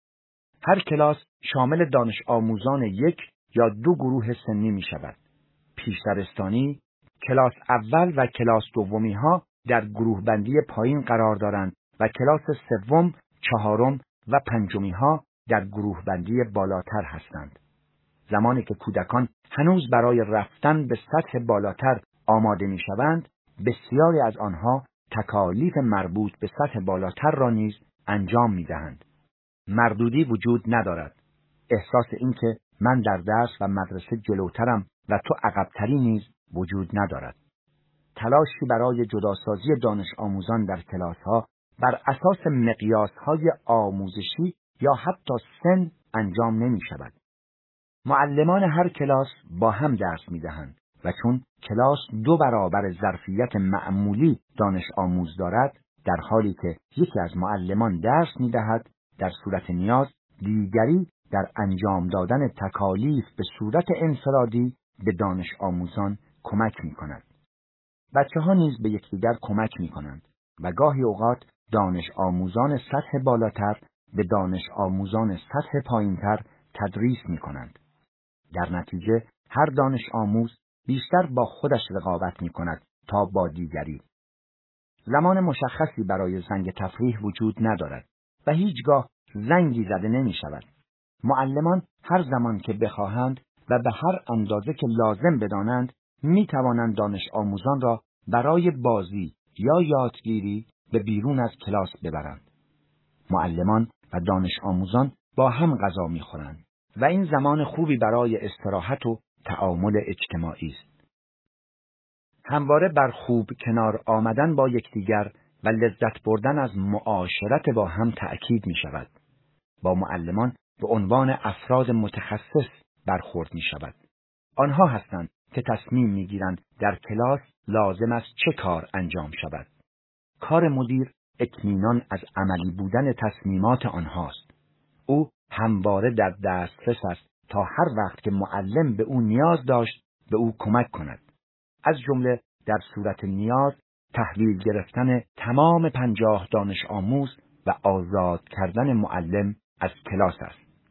هر کلاس شامل دانش آموزان یک یا دو گروه سنی می شود. پیشدبستانی، کلاس اول و کلاس دومی ها در گروه بندی پایین قرار دارند و کلاس سوم، چهارم و پنجمی ها در گروه بندی بالاتر هستند. زمانی که کودکان هنوز برای رفتن به سطح بالاتر آماده می‌شوند، بسیاری از آنها تکالیف مربوط به سطح بالاتر را نیز انجام می‌دهند. مردودی وجود ندارد. احساس این که من در درس و مدرسه جلوترم و تو عقب‌تری نیز وجود ندارد. تلاشی برای جداسازی دانش آموزان در کلاس‌ها بر اساس مقیاس‌های آموزشی یا حتی سن انجام نمی‌شود. معلمان هر کلاس با هم درس می‌دهند و چون کلاس دو برابر ظرفیت معمولی دانش آموز دارد، در حالی که یکی از معلمان درس می‌دهد، در صورت نیاز دیگری در انجام دادن تکالیف به صورت انفرادی به دانش آموزان کمک می‌کند. بچه‌ها نیز به یکدیگر کمک می‌کنند و گاهی اوقات دانش آموزان سطح بالاتر به دانش آموزان سطح پایینتر تدریس می‌کنند. در نتیجه هر دانش آموز بیشتر با خودش رقابت می‌کند تا با دیگری. زمان مشخصی برای زنگ تفریح وجود ندارد و هیچگاه زنگی زده نمی‌شود. معلمان هر زمان که بخواهند و به هر اندازه که لازم بدانند می‌توانند دانش آموزان را برای بازی یا یادگیری به بیرون از کلاس ببرند. معلمان و دانش آموزان با هم غذا می‌خورند و این زمان خوبی برای استراحت و تعامل اجتماعی است. همواره بر خوب کنار آمدن با یکدیگر و لذت بردن از معاشرت با هم تأکید می‌شود. با معلمان به عنوان افراد متخصص برخورد می‌شود. آنها هستند که تصمیم می‌گیرند در کلاس لازم است چه کار انجام شود. کار مدیر اطمینان از عملی بودن تصمیمات آنهاست. او همواره در دسترس است تا هر وقت که معلم به او نیاز داشت به او کمک کند. از جمله در صورت نیاز تحویل گرفتن تمام پنجاه دانش آموز و آزاد کردن معلم از کلاس است.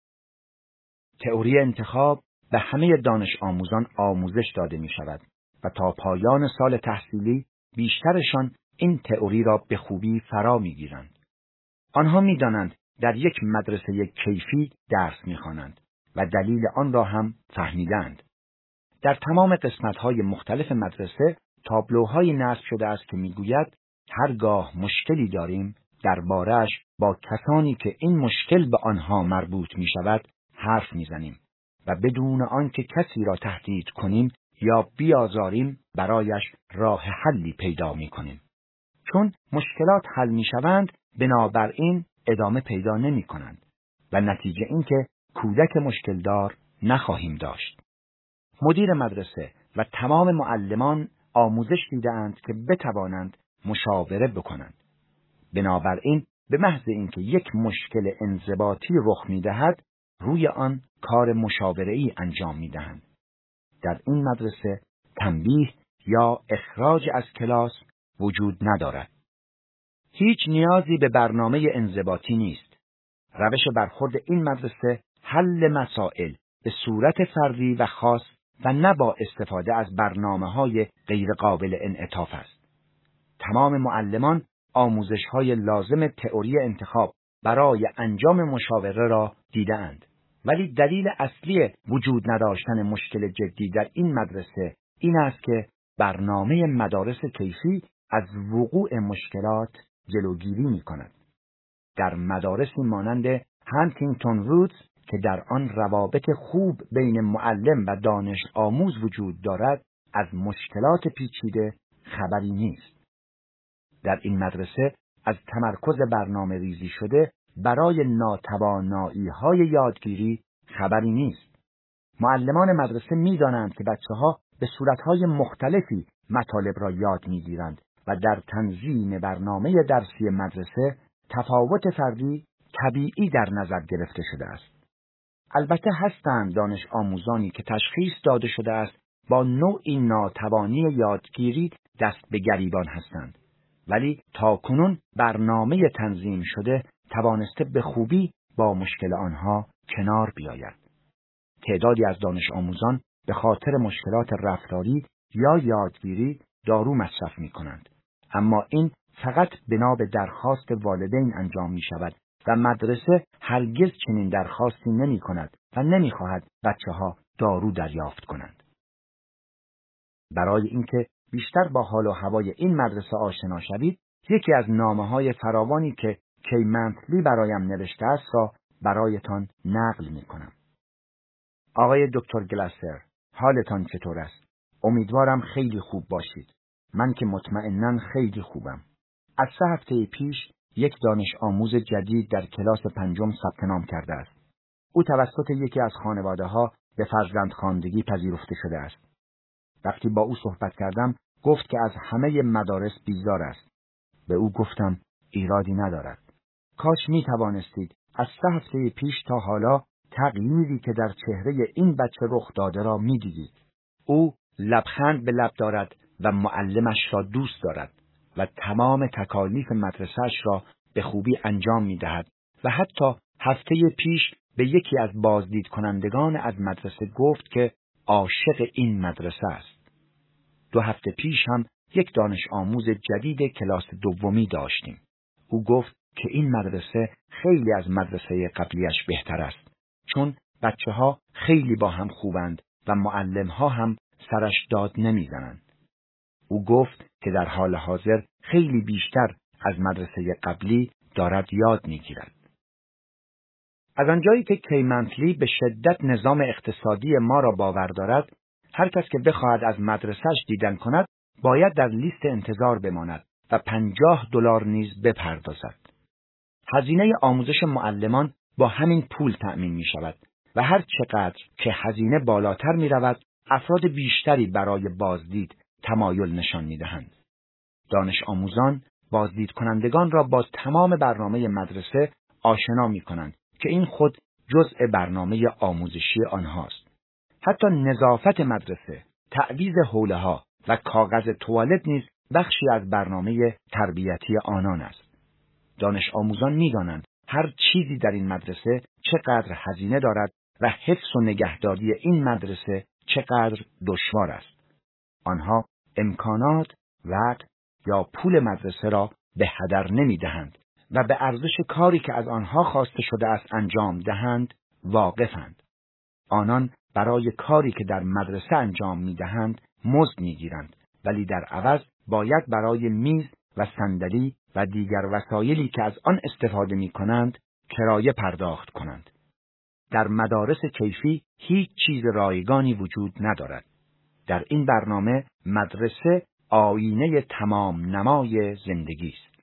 تئوری انتخاب به همه دانش آموزان آموزش داده می شود و تا پایان سال تحصیلی بیشترشان این تئوری را به خوبی فرا می گیرند. آنها می دانند در یک مدرسه کیفی درس می خوانند و دلیل آن را هم فهمیدند. در تمام قسمت‌های مختلف مدرسه تابلوهای نصب شده است که می گوید هرگاه مشکلی داریم درباره‌اش با کسانی که این مشکل به آنها مربوط می شود حرف می زنیم و بدون آنکه کسی را تهدید کنیم یا بیازاریم برایش راه حلی پیدا می کنیم. چون مشکلات حل می شوند بنابراین ادامه پیدا نمی کنند و نتیجه این که کودک مشکل دار نخواهیم داشت. مدیر مدرسه و تمام معلمان آموزش دیده‌اند که بتوانند مشاوره بکنند. بنابراین به محض اینکه یک مشکل انضباطی رخ می دهد روی آن کار مشاوره‌ای انجام می دهند. در این مدرسه تنبیه یا اخراج از کلاس وجود ندارد. هیچ نیازی به برنامه انضباطی نیست. روش برخورد این مدرسه حل مسائل به صورت فردی و خاص و نه با استفاده از برنامه‌های غیر قابل انعطاف است. تمام معلمان آموزش‌های لازم تئوری انتخاب برای انجام مشاوره را دیده‌اند. ولی دلیل اصلی وجود نداشتن مشکل جدی در این مدرسه این است که برنامه مدارس کیفی از وقوع مشکلات جلوگیری می‌کند. در مدارسی مانند هانتینگتون وودز که در آن روابط خوب بین معلم و دانش آموز وجود دارد، از مشکلات پیچیده خبری نیست. در این مدرسه از تمرکز برنامه ریزی شده برای ناتوانایی‌های یادگیری خبری نیست. معلمان مدرسه می‌دانند که بچه‌ها به صورت‌های مختلفی مطالب را یاد می‌گیرند و در تنظیم برنامه درسی مدرسه تفاوت فردی طبیعی در نظر گرفته شده است. البته هستند دانش آموزانی که تشخیص داده شده است با نوعی ناتوانی یادگیری دست به گریبان هستند، ولی تاکنون برنامه تنظیم شده توانسته به خوبی با مشکل آنها کنار بیاید. تعدادی از دانش آموزان به خاطر مشکلات رفتاری یا یادگیری دارو مصرف می کنند، اما این فقط بنا به درخواست والدین انجام می شود و مدرسه هرگز چنین درخواستی نمی کند و نمیخواهد بچه‌ها دارو دریافت کنند. برای اینکه بیشتر با حال و هوای این مدرسه آشنا شوید، یکی از نامه‌های فراوانی که کی منتلی برایم نوشته است را برایتان نقل می‌کنم. آقای دکتر گلاسر، حالتان چطور است؟ امیدوارم خیلی خوب باشید. من که مطمئناً خیلی خوبم. از سه هفته پیش یک دانش آموز جدید در کلاس پنجم ثبت نام کرده است. او توسط یکی از خانواده‌ها به فرزندخواندگی پذیرفته شده است. وقتی با او صحبت کردم، گفت که از همه مدارس بیزار است. به او گفتم ایرادی ندارد. کاش می توانستید از سه هفته پیش تا حالا تغییری که در چهره این بچه رخ داده را می دیدید. او لبخند به لب دارد و معلمش را دوست دارد و تمام تکالیف مدرسه‌اش را به خوبی انجام می دهد و حتی هفته پیش به یکی از بازدید کنندگان از مدرسه گفت که عاشق این مدرسه است. دو هفته پیش هم یک دانش آموز جدید کلاس دومی داشتیم. او گفت که این مدرسه خیلی از مدرسه قبلیش بهتر است، چون بچه ها خیلی با هم خوبند و معلم ها هم سرش داد نمیزنند. او گفت که در حال حاضر خیلی بیشتر از مدرسه قبلی دارد یاد میگیرد. از آنجایی که کی منتلی به شدت نظام اقتصادی ما را باور دارد، هر کس که بخواهد از مدرسه‌اش دیدن کند، باید در لیست انتظار بماند و پنجاه دلار نیز بپردازد. هزینه آموزش معلمان با همین پول تأمین می شود و هر چقدر که هزینه بالاتر می رود، افراد بیشتری برای بازدید تمایل نشان می دهند. دانش آموزان بازدید کنندگان را با تمام برنامه مدرسه آشنا می کنند که این خود جزء برنامه آموزشی آنهاست. حتی نظافت مدرسه، تعویض حوله‌ها و کاغذ توالت نیز بخشی از برنامه تربیتی آنان است. دانش آموزان می‌دانند هر چیزی در این مدرسه چقدر هزینه دارد و حفظ و نگهداری این مدرسه چقدر دشوار است. آنها امکانات، وقت یا پول مدرسه را به هدر نمی‌دهند و به ارزش کاری که از آنها خواسته شده است انجام دهند واقفند. آنان برای کاری که در مدرسه انجام می‌دهند مزد می‌گیرند، ولی در عوض باید برای میز و صندلی و دیگر وسایلی که از آن استفاده می‌کنند کرایه پرداخت کنند. در مدارس کیفی هیچ چیز رایگانی وجود ندارد. در این برنامه مدرسه آینه تمام نمای زندگی است.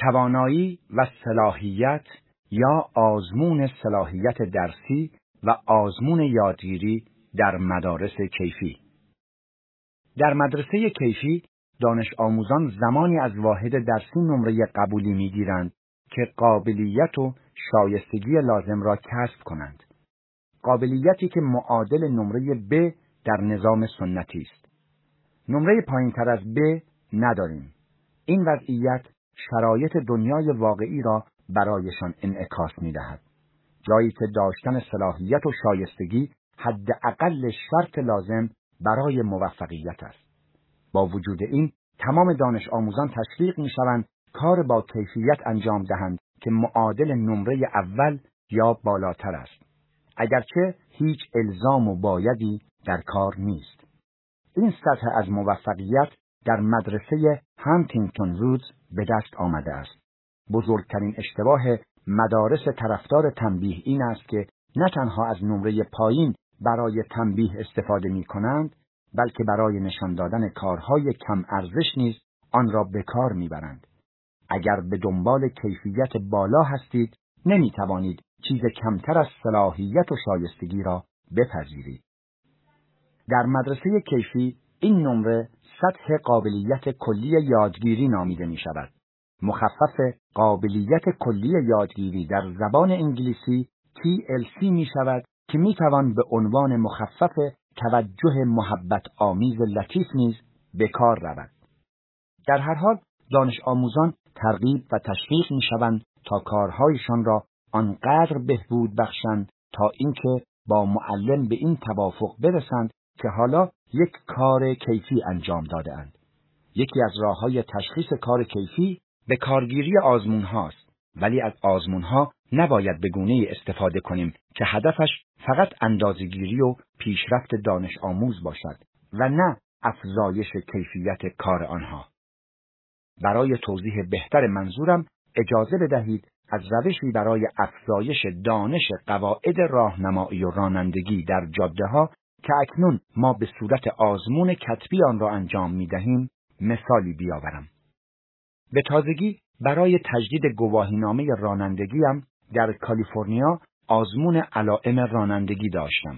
توانایی و صلاحیت یا آزمون صلاحیت درسی و آزمون یادگیری در مدارس کیفی. در مدرسه کیفی دانش آموزان زمانی از واحد درسی نمره قبولی می‌گیرند که قابلیت و شایستگی لازم را کسب کنند. قابلیتی که معادل نمره ب در نظام سنتی است. نمره پایین‌تر از ب نداریم. این وضعیت شرایط دنیای واقعی را برایشان انعکاس می‌دهد. جایی که داشتن صلاحیت و شایستگی حداقل شرط لازم برای موفقیت است. با وجود این، تمام دانش آموزان تشویق می‌شوند کار با کیفیت انجام دهند که معادل نمره اول یا بالاتر است، اگرچه هیچ الزام و بایدی در کار نیست. این سطح از موفقیت در مدرسه هانتینگتون وودز به دست آمده است. بزرگترین اشتباه مدارس طرفدار تنبیه این است که نه تنها از نمره پایین برای تنبیه استفاده می کنند، بلکه برای نشان دادن کارهای کم ارزش نیز آن را به کار می برند. اگر به دنبال کیفیت بالا هستید، نمی توانید چیز کمتر از صلاحیت و شایستگی را بپذیرید. در مدرسه کیفی این نمره سطح قابلیت کلی یادگیری نامیده می شود. مخفف قابلیت کلی یادگیری در زبان انگلیسی تی ال سی می شود که می توان به عنوان مخفف توجه محبت آمیز لطیف نیز به کار رود. در هر حال دانش آموزان ترغیب و تشویق می شوند تا کارهایشان را آنقدر بهبود بخشند تا اینکه با معلم به این توافق برسند که حالا یک کار کیفی انجام داده اند. یکی از راه‌های تشخیص کار کیفی به کارگیری آزمون هاست، ولی از آزمون ها نباید به گونه‌ای استفاده کنیم که هدفش فقط اندازه‌گیری و پیشرفت دانش آموز باشد و نه افزایش کیفیت کار آنها. برای توضیح بهتر منظورم اجازه بدهید از روشی برای افزایش دانش قواعد راهنمایی و رانندگی در جاده‌ها که اکنون ما به صورت آزمون کتبی آن را انجام می‌دهیم مثالی بیاورم. به تازگی برای تجدید گواهینامه رانندگیم در کالیفرنیا آزمون علائم رانندگی داشتم.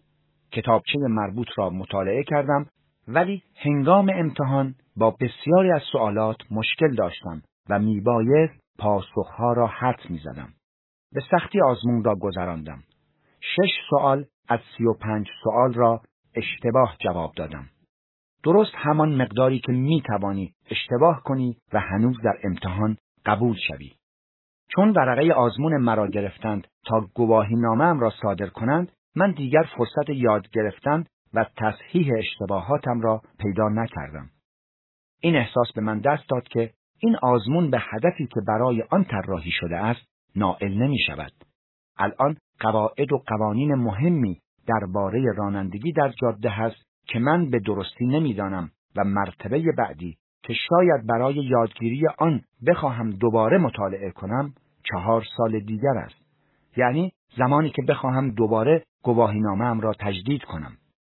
کتابچه مربوط را مطالعه کردم، ولی هنگام امتحان با بسیاری از سوالات مشکل داشتم و میبایست پاسخها را حدس میزدم. به سختی آزمون را گذراندم. شش سوال از سی و پنج سوال را اشتباه جواب دادم. درست همان مقداری که می توانی اشتباه کنی و هنوز در امتحان قبول شوی. چون ورقه آزمون مرا گرفتند تا گواهینامه‌ام را صادر کنند، من دیگر فرصت یاد گرفتن و تصحیح اشتباهاتم را پیدا نکردم. این احساس به من دست داد که این آزمون به هدفی که برای آن طراحی شده است نائل نمی شود. الان قواعد و قوانین مهمی درباره رانندگی در جاده هست که من به درستی نمیدانم و مرتبه بعدی که شاید برای یادگیری آن بخواهم دوباره مطالعه کنم چهار سال دیگر است. یعنی زمانی که بخواهم دوباره گواهینامه‌ام را تجدید کنم.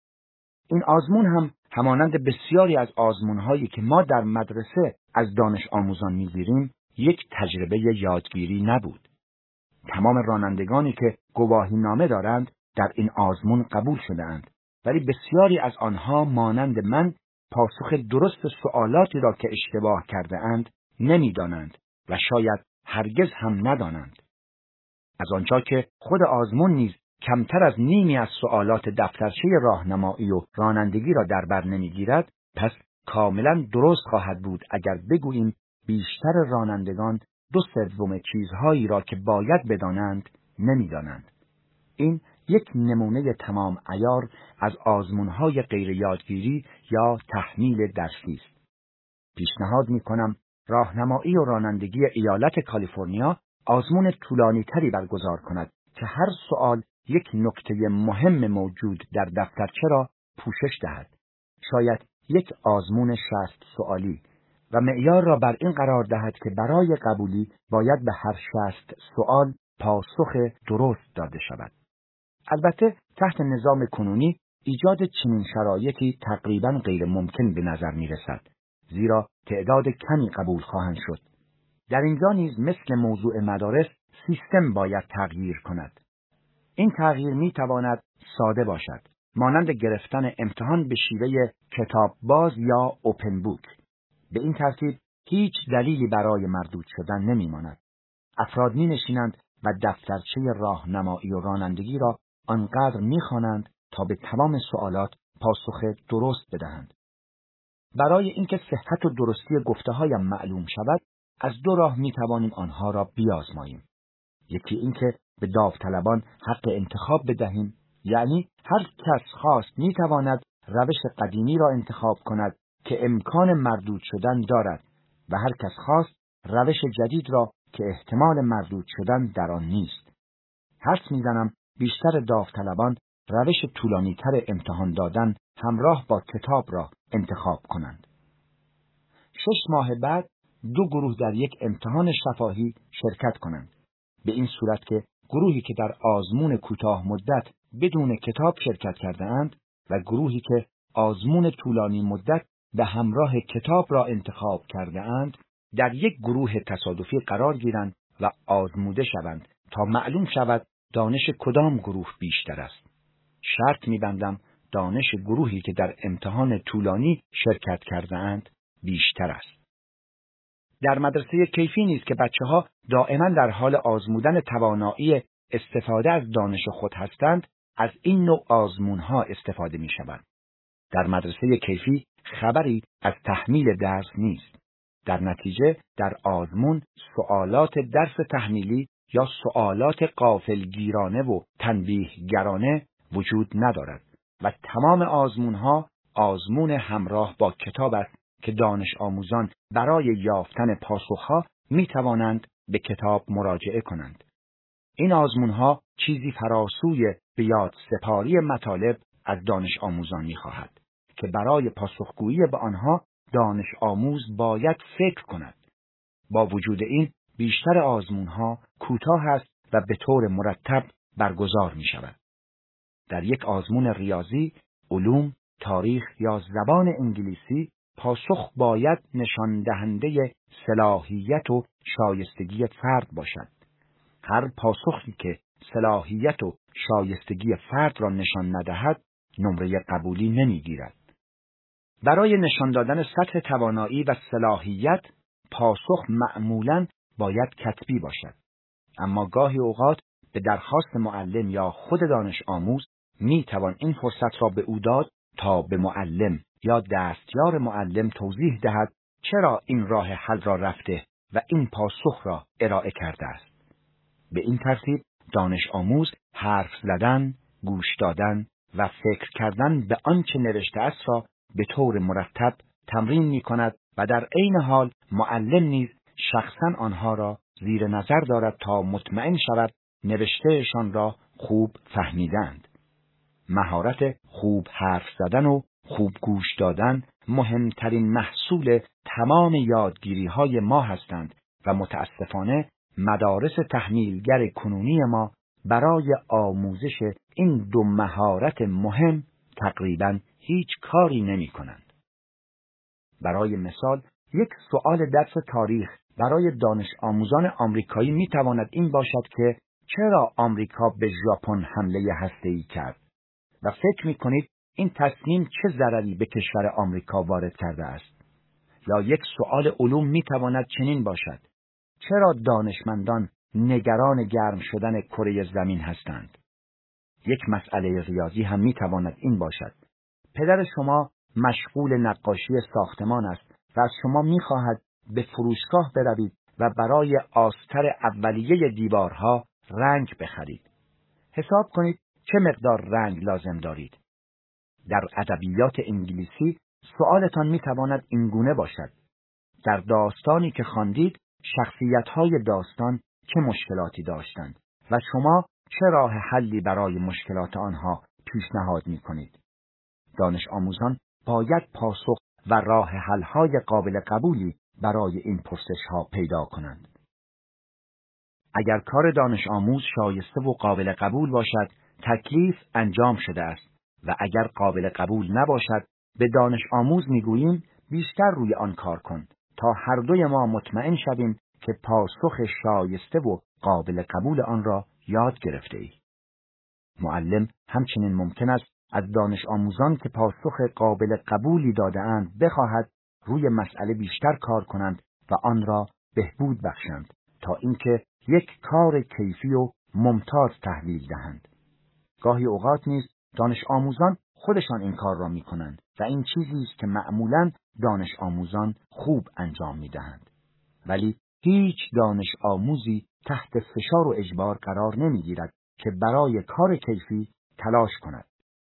این آزمون هم همانند بسیاری از آزمون‌هایی که ما در مدرسه از دانش آموزان می‌گیریم یک تجربه یادگیری نبود. تمام رانندگانی که گواهینامه دارند در این آزمون قبول شده‌اند، ولی بسیاری از آنها مانند من پاسخ درست سوالاتی را که اشتباه کرده اند نمی‌دانند و شاید هرگز هم ندانند. از آنجا که خود آزمون نیز کمتر از نیمی از سوالات دفترچه راهنمایی و رانندگی را در بر نمی‌گیرد، پس کاملا درست خواهد بود اگر بگوییم بیشتر رانندگان دو سوم چیزهایی را که باید بدانند نمی‌دانند. این یک نمونه تمام عیار از آزمون‌های غیر یادگیری یا تحمیل درسی است. پیشنهاد می‌کنم راهنمایی و رانندگی ایالت کالیفرنیا آزمون طولانی‌تری برگزار کند که هر سوال یک نکته مهم موجود در دفترچه را پوشش دهد. شاید یک آزمون شصت سوالی و معیار را بر این قرار دهد که برای قبولی باید به هر شصت سوال پاسخ درست داده شود. البته تحت نظام کنونی ایجاد چنین شرایطی تقریباً غیر ممکن به نظر می رسد، زیرا تعداد کمی قبول خواهند شد. در اینجا نیز مثل موضوع مدارس سیستم باید تغییر کند. این تغییر می تواند ساده باشد، مانند گرفتن امتحان به شیوه کتاب باز یا اوپن بوک. به این ترتیب هیچ دلیلی برای مردود شدن نمی ماند. افراد می نشینند و دفترچه راهنمایی و رانندگی را آنقدر می خوانند تا به تمام سوالات پاسخ درست بدهند. برای اینکه صحت و درستی گفته‌هایم معلوم شود، از دو راه می توانیم آنها را بیازماییم. یکی اینکه به داوطلبان حق انتخاب بدهیم، یعنی هر کس خواست می تواند روش قدیمی را انتخاب کند که امکان مردود شدن دارد و هر کس خواست روش جدید را که احتمال مردود شدن در آن نیست. حدس می‌زنم بیشتر داوطلبان روش طولانی‌تر امتحان دادن همراه با کتاب را انتخاب کنند. شش ماه بعد دو گروه در یک امتحان شفاهی شرکت کنند. به این صورت که گروهی که در آزمون کوتاه مدت بدون کتاب شرکت کرده اند و گروهی که آزمون طولانی مدت به همراه کتاب را انتخاب کرده اند در یک گروه تصادفی قرار گیرند و آزموده شوند تا معلوم شود دانش کدام گروه بیشتر است. شرط می‌بندم دانش گروهی که در امتحان طولانی شرکت کرده اند بیشتر است. در مدرسه کیفی نیست که بچه‌ها دائما در حال آزمودن توانایی استفاده از دانش خود هستند، از این نوع آزمون‌ها استفاده می‌شود. در مدرسه کیفی خبری از تحمیل درس نیست. در نتیجه در آزمون سوالات درس تحمیلی یا سوالات غافلگیرانه و تنبیهگرانه وجود ندارد و تمام آزمون‌ها آزمون همراه با کتاب است که دانش آموزان برای یافتن پاسخها می توانند به کتاب مراجعه کنند. این آزمون‌ها چیزی فراسوی به یاد سپاری مطالب از دانش آموزان می خواهد که برای پاسخگویی به آنها دانش آموز باید فکر کند. با وجود این بیشتر آزمون‌ها کوتاه است و به طور مرتب برگزار می شود. در یک آزمون ریاضی، علوم، تاریخ یا زبان انگلیسی پاسخ باید نشان دهنده صلاحیت و شایستگی فرد باشد. هر پاسخی که صلاحیت و شایستگی فرد را نشان ندهد، نمره قبولی نمیگیرد. برای نشان دادن سطح توانایی و صلاحیت، پاسخ معمولاً باید کتبی باشد. اما گاهی اوقات به درخواست معلم یا خود دانش آموز می توان این فرصت را به او داد تا به معلم یا دستیار معلم توضیح دهد چرا این راه حل را رفته و این پاسخ را ارائه کرده است. به این ترتیب دانش آموز حرف زدن، گوش دادن و فکر کردن به آنچه نوشته است را به طور مرتب تمرین می کند و در عین حال معلم نیز شخصا آنها را زیر نظر دارد تا مطمئن شود نوشتهشان را خوب فهمیدند. مهارت خوب حرف زدن و خوب گوش دادن مهمترین محصول تمام یادگیری های ما هستند و متاسفانه مدارس تحمیلگر کنونی ما برای آموزش این دو مهارت مهم تقریباً هیچ کاری نمی کنند. برای مثال، یک سؤال درس تاریخ برای دانش آموزان آمریکایی می تواند این باشد که چرا آمریکا به ژاپن حمله هسته‌ای کرد و فکر می کنید این تصمیم چه ضرری به کشور آمریکا وارد کرده است. یا یک سؤال علوم می تواند چنین باشد: چرا دانشمندان نگران گرم شدن کره زمین هستند؟ یک مسئله ریاضی هم می تواند این باشد: پدر شما مشغول نقاشی ساختمان است و از شما می خواهد به فروشگاه بروید و برای آستر اولیه دیوارها رنگ بخرید. حساب کنید چه مقدار رنگ لازم دارید. در ادبیات انگلیسی سؤالتان می تواند اینگونه باشد: در داستانی که خواندید شخصیت‌های داستان چه مشکلاتی داشتند و شما چه راه حلی برای مشکلات آنها پیشنهاد می کنید؟ دانش آموزان باید پاسخ و راه حل‌های قابل قبولی برای این پرسش‌ها پیدا کنند. اگر کار دانش آموز شایسته و قابل قبول باشد، تکلیف انجام شده است و اگر قابل قبول نباشد، به دانش آموز میگوییم بیشتر روی آن کار کن تا هر دوی ما مطمئن شویم که پاسخ شایسته و قابل قبول آن را یاد گرفته ای. معلم همچنین ممکن است از دانش آموزان که پاسخ قابل قبولی داده‌اند بخواهد روی مسئله بیشتر کار کنند و آن را بهبود بخشند تا اینکه یک کار کیفی و ممتاز تحویل دهند. گاهی اوقات نیز دانش آموزان خودشان این کار را می کنند و این چیزی است که معمولاً دانش آموزان خوب انجام می دهند. ولی هیچ دانش آموزی تحت فشار و اجبار قرار نمی گیرد که برای کار کیفی تلاش کند.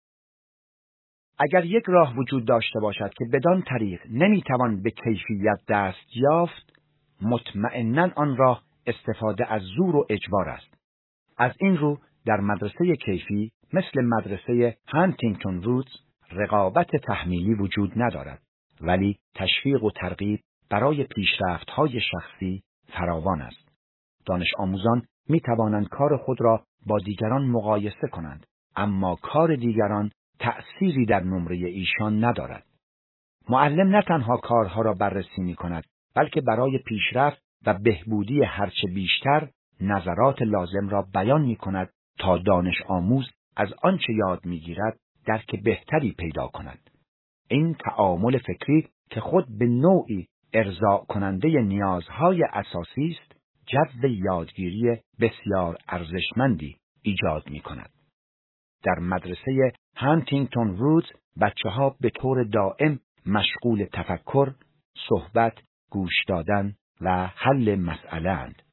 اگر یک راه وجود داشته باشد که بدان طریق نمی توان به کیفیت دست یافت، مطمئناً آن راه استفاده از زور و اجبار است. از این رو در مدرسه کیفی مثل مدرسه هانتینگتون وودز رقابت تحمیلی وجود ندارد، ولی تشویق و ترغیب برای پیشرفت‌های شخصی فراوان است. دانش آموزان می توانند کار خود را با دیگران مقایسه کنند، اما کار دیگران تأثیری در نمره ایشان ندارد. معلم نه تنها کارها را بررسی می کند، بلکه برای پیشرفت و بهبودی هرچه بیشتر نظرات لازم را بیان می کند تا دانش آموز از آنچه یاد می گیرد درک بهتری پیدا کند. این تعامل فکری که خود به نوعی ارضاء کننده نیازهای اساسی است، جو یادگیری بسیار ارزشمندی ایجاد می کند. در مدرسه هانتینگتون وودز بچه‌ها به طور دائم مشغول تفکر، صحبت، گوش دادن و حل مسئله اند.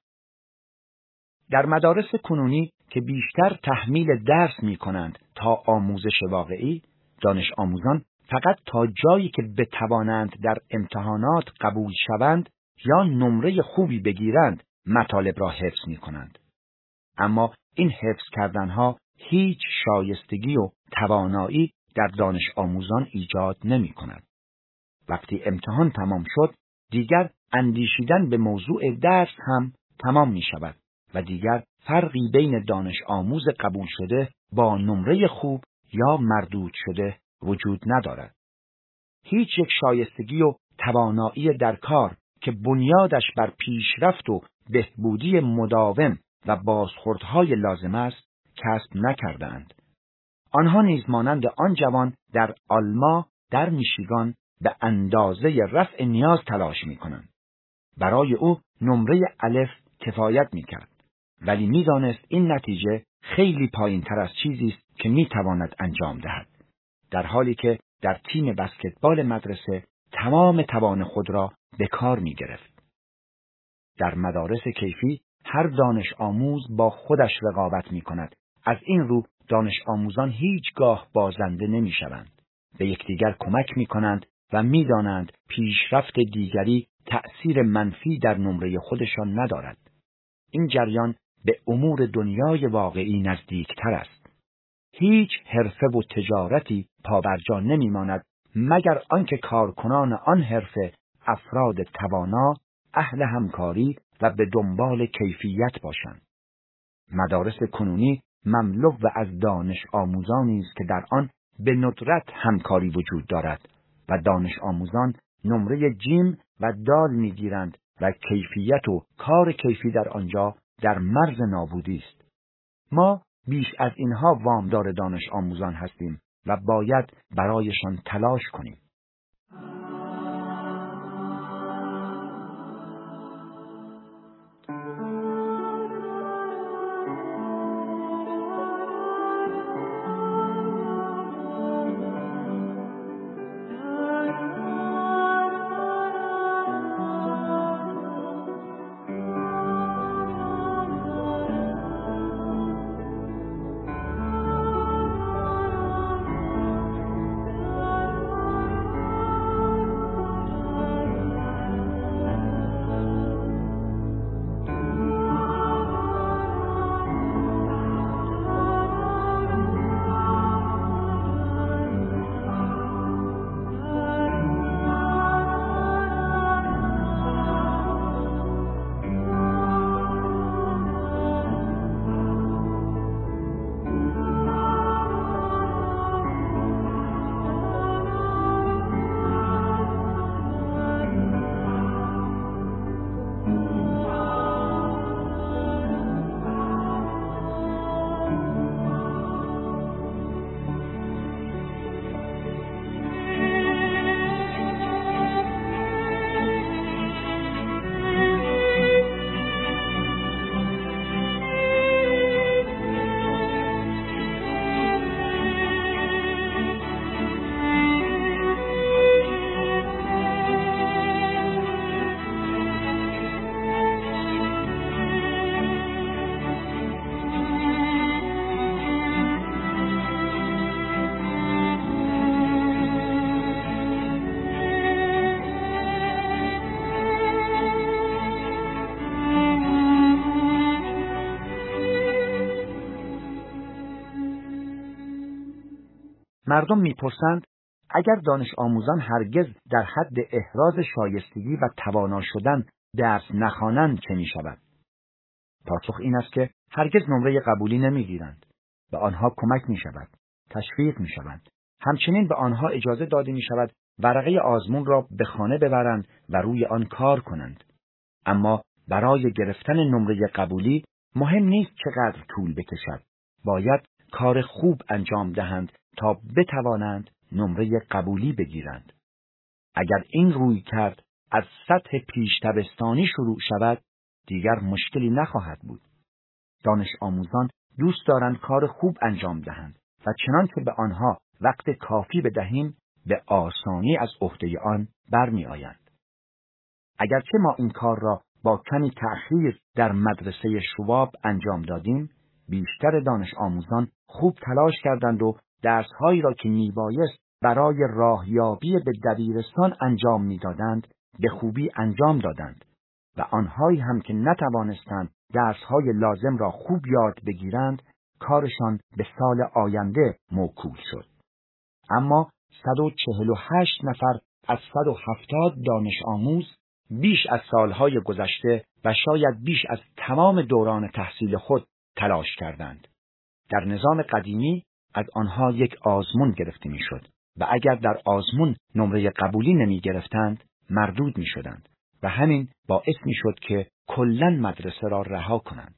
در مدارس کنونی که بیشتر تحمیل درس می کنند تا آموزش واقعی، دانش آموزان فقط تا جایی که بتوانند در امتحانات قبول شوند یا نمره خوبی بگیرند مطالب را حفظ می کنند. اما این حفظ کردنها هیچ شایستگی و توانایی در دانش آموزان ایجاد نمی کند. وقتی امتحان تمام شد، دیگر اندیشیدن به موضوع درس هم تمام می شود و دیگر فرقی بین دانش آموز قبول شده با نمره خوب یا مردود شده وجود ندارد. هیچ یک شایستگی و توانایی در کار که بنیادش بر پیشرفت و بهبودی مداوم و بازخوردهای لازم است کسب نکردند. آنها نیز مانند آن جوان در آلما در میشیگان به اندازه رفع نیاز تلاش می کنند. برای او نمره الف کفایت می کرد، ولی می دانست این نتیجه خیلی پایین تر از چیزی است که می تواند انجام دهد، در حالی که در تیم بسکتبال مدرسه تمام توان خود را به کار می گرفت. در مدارس کیفی هر دانش آموز با خودش رقابت می کند. از این رو دانش آموزان هیچگاه بازنده نمی شوند. به یکدیگر کمک می کنند و می دانند پیشرفت دیگری تأثیر منفی در نمره خودشان ندارد. این جریان به امور دنیای واقعی نزدیکتر است. هیچ حرفه و تجارتی پابرجا نمی ماند مگر آنکه کارکنان آن حرفه افراد توانا، اهل همکاری و به دنبال کیفیت باشند. مدارس کنونی مملو و از دانش آموزانی است که در آن به ندرت همکاری وجود دارد و دانش آموزان نمره جیم و دال میگیرند و کیفیت و کار کیفی در آنجا در مرز نابودی است. ما بیش از اینها وامدار دانش آموزان هستیم و باید برایشان تلاش کنیم. مردم میپرسند اگر دانش آموزان هرگز در حد احراز شایستگی و توانا شدن درس نخوانند چه میشود؟ پاسخ این است که هرگز نمره قبولی نمیگیرند. به آنها کمک میشود، تشویق میشوند. همچنین به آنها اجازه داده میشود ورقه آزمون را به خانه ببرند و روی آن کار کنند. اما برای گرفتن نمره قبولی مهم نیست چقدر طول بکشد. باید کار خوب انجام دهند تا بتوانند نمره قبولی بگیرند. اگر این روی کرد از سطح پیش دبستانی شروع شود، دیگر مشکلی نخواهد بود. دانش آموزان دوست دارند کار خوب انجام دهند و چنان که به آنها وقت کافی بدهیم به آسانی از عهده آن برمی آیند. اگرچه ما این کار را با کمی تأخیر در مدرسه شواب انجام دادیم، بیشتر دانش آموزان خوب تلاش کردند و درس‌هایی را که میبایست برای راهیابی به دبیرستان انجام میدادند به خوبی انجام دادند و آنهایی هم که نتوانستند درس‌های لازم را خوب یاد بگیرند کارشان به سال آینده موکول شد. اما صد و چهل و هشت نفر از صد و هفتاد دانش آموز بیش از سالهای گذشته و شاید بیش از تمام دوران تحصیل خود تلاش کردند. در نظام قدیمی از آنها یک آزمون گرفته میشد و اگر در آزمون نمره قبولی نمی گرفتند مردود می شدند و همین باعث می شد که کلاً مدرسه را رها کنند.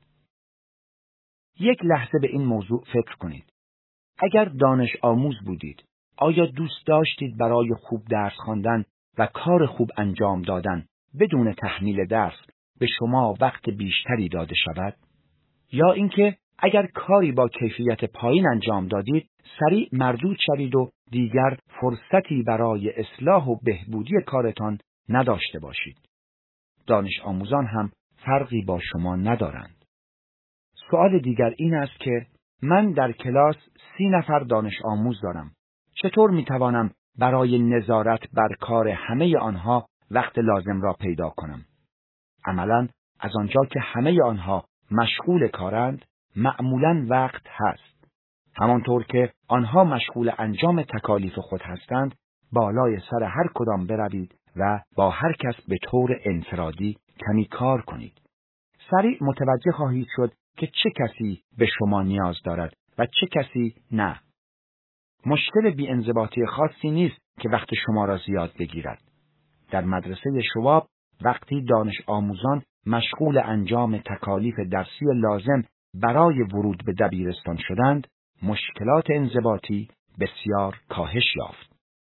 یک لحظه به این موضوع فکر کنید. اگر دانش آموز بودید، آیا دوست داشتید برای خوب درس خواندن و کار خوب انجام دادن بدون تحمیل درس به شما وقت بیشتری داده شود؟ یا اینکه اگر کاری با کیفیت پایین انجام دادید، سریع مردود شوید و دیگر فرصتی برای اصلاح و بهبودی کارتان نداشته باشید؟ دانش آموزان هم فرقی با شما ندارند. سوال دیگر این است که من در کلاس سی نفر دانش آموز دارم. چطور می توانم برای نظارت بر کار همه آنها وقت لازم را پیدا کنم؟ عملاً از آنجا که همه آنها مشغول کارند، معمولاً وقت هست. همانطور که آنها مشغول انجام تکالیف خود هستند، بالای سر هر کدام بروید و با هر کس به طور انفرادی کمی کار کنید. سریع متوجه خواهید شد که چه کسی به شما نیاز دارد و چه کسی نه. مشکل بی‌انضباطی خاصی نیست که وقت شما را زیاد بگیرد. در مدرسه شواب وقتی دانش آموزان مشغول انجام تکالیف درسی لازم برای ورود به دبیرستان شدند، مشکلات انضباطی بسیار کاهش یافت.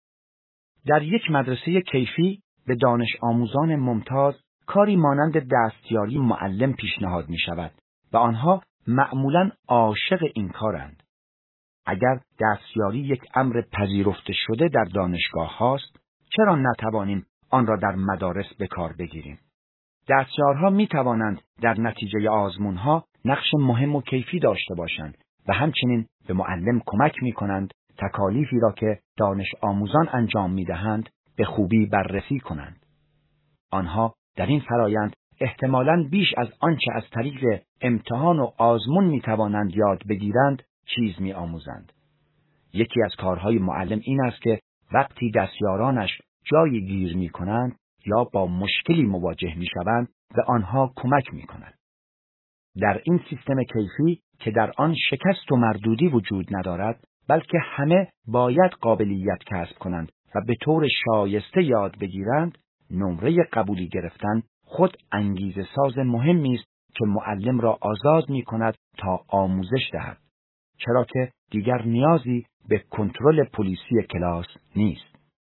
در یک مدرسه کیفی به دانش آموزان ممتاز کاری مانند دستیاری معلم پیشنهاد می شود و آنها معمولاً عاشق این کارند. اگر دستیاری یک امر پذیرفته شده در دانشگاه هاست، چرا نتوانیم آن را در مدارس به کار بگیریم؟ دستیارها می توانند در نتیجه آزمون ها نقش مهم و کیفی داشته باشند و همچنین به معلم کمک می کنند تکالیفی را که دانش آموزان انجام می دهند به خوبی بررسی کنند. آنها در این فرایند احتمالاً بیش از آنچه از طریق امتحان و آزمون می توانند یاد بگیرند چیز می آموزند. یکی از کارهای معلم این است که وقتی دستیارانش جایی گیر می کنند یا با مشکلی مواجه می شوند به آنها کمک می کنند. در این سیستم کیفی که در آن شکست و مردودی وجود ندارد، بلکه همه باید قابلیت کسب کنند و به طور شایسته یاد بگیرند، نمره قبولی گرفتن خود انگیزه ساز مهمی است که معلم را آزاد می کند تا آموزش دهد، چرا که دیگر نیازی به کنترل پلیسی کلاس نیست.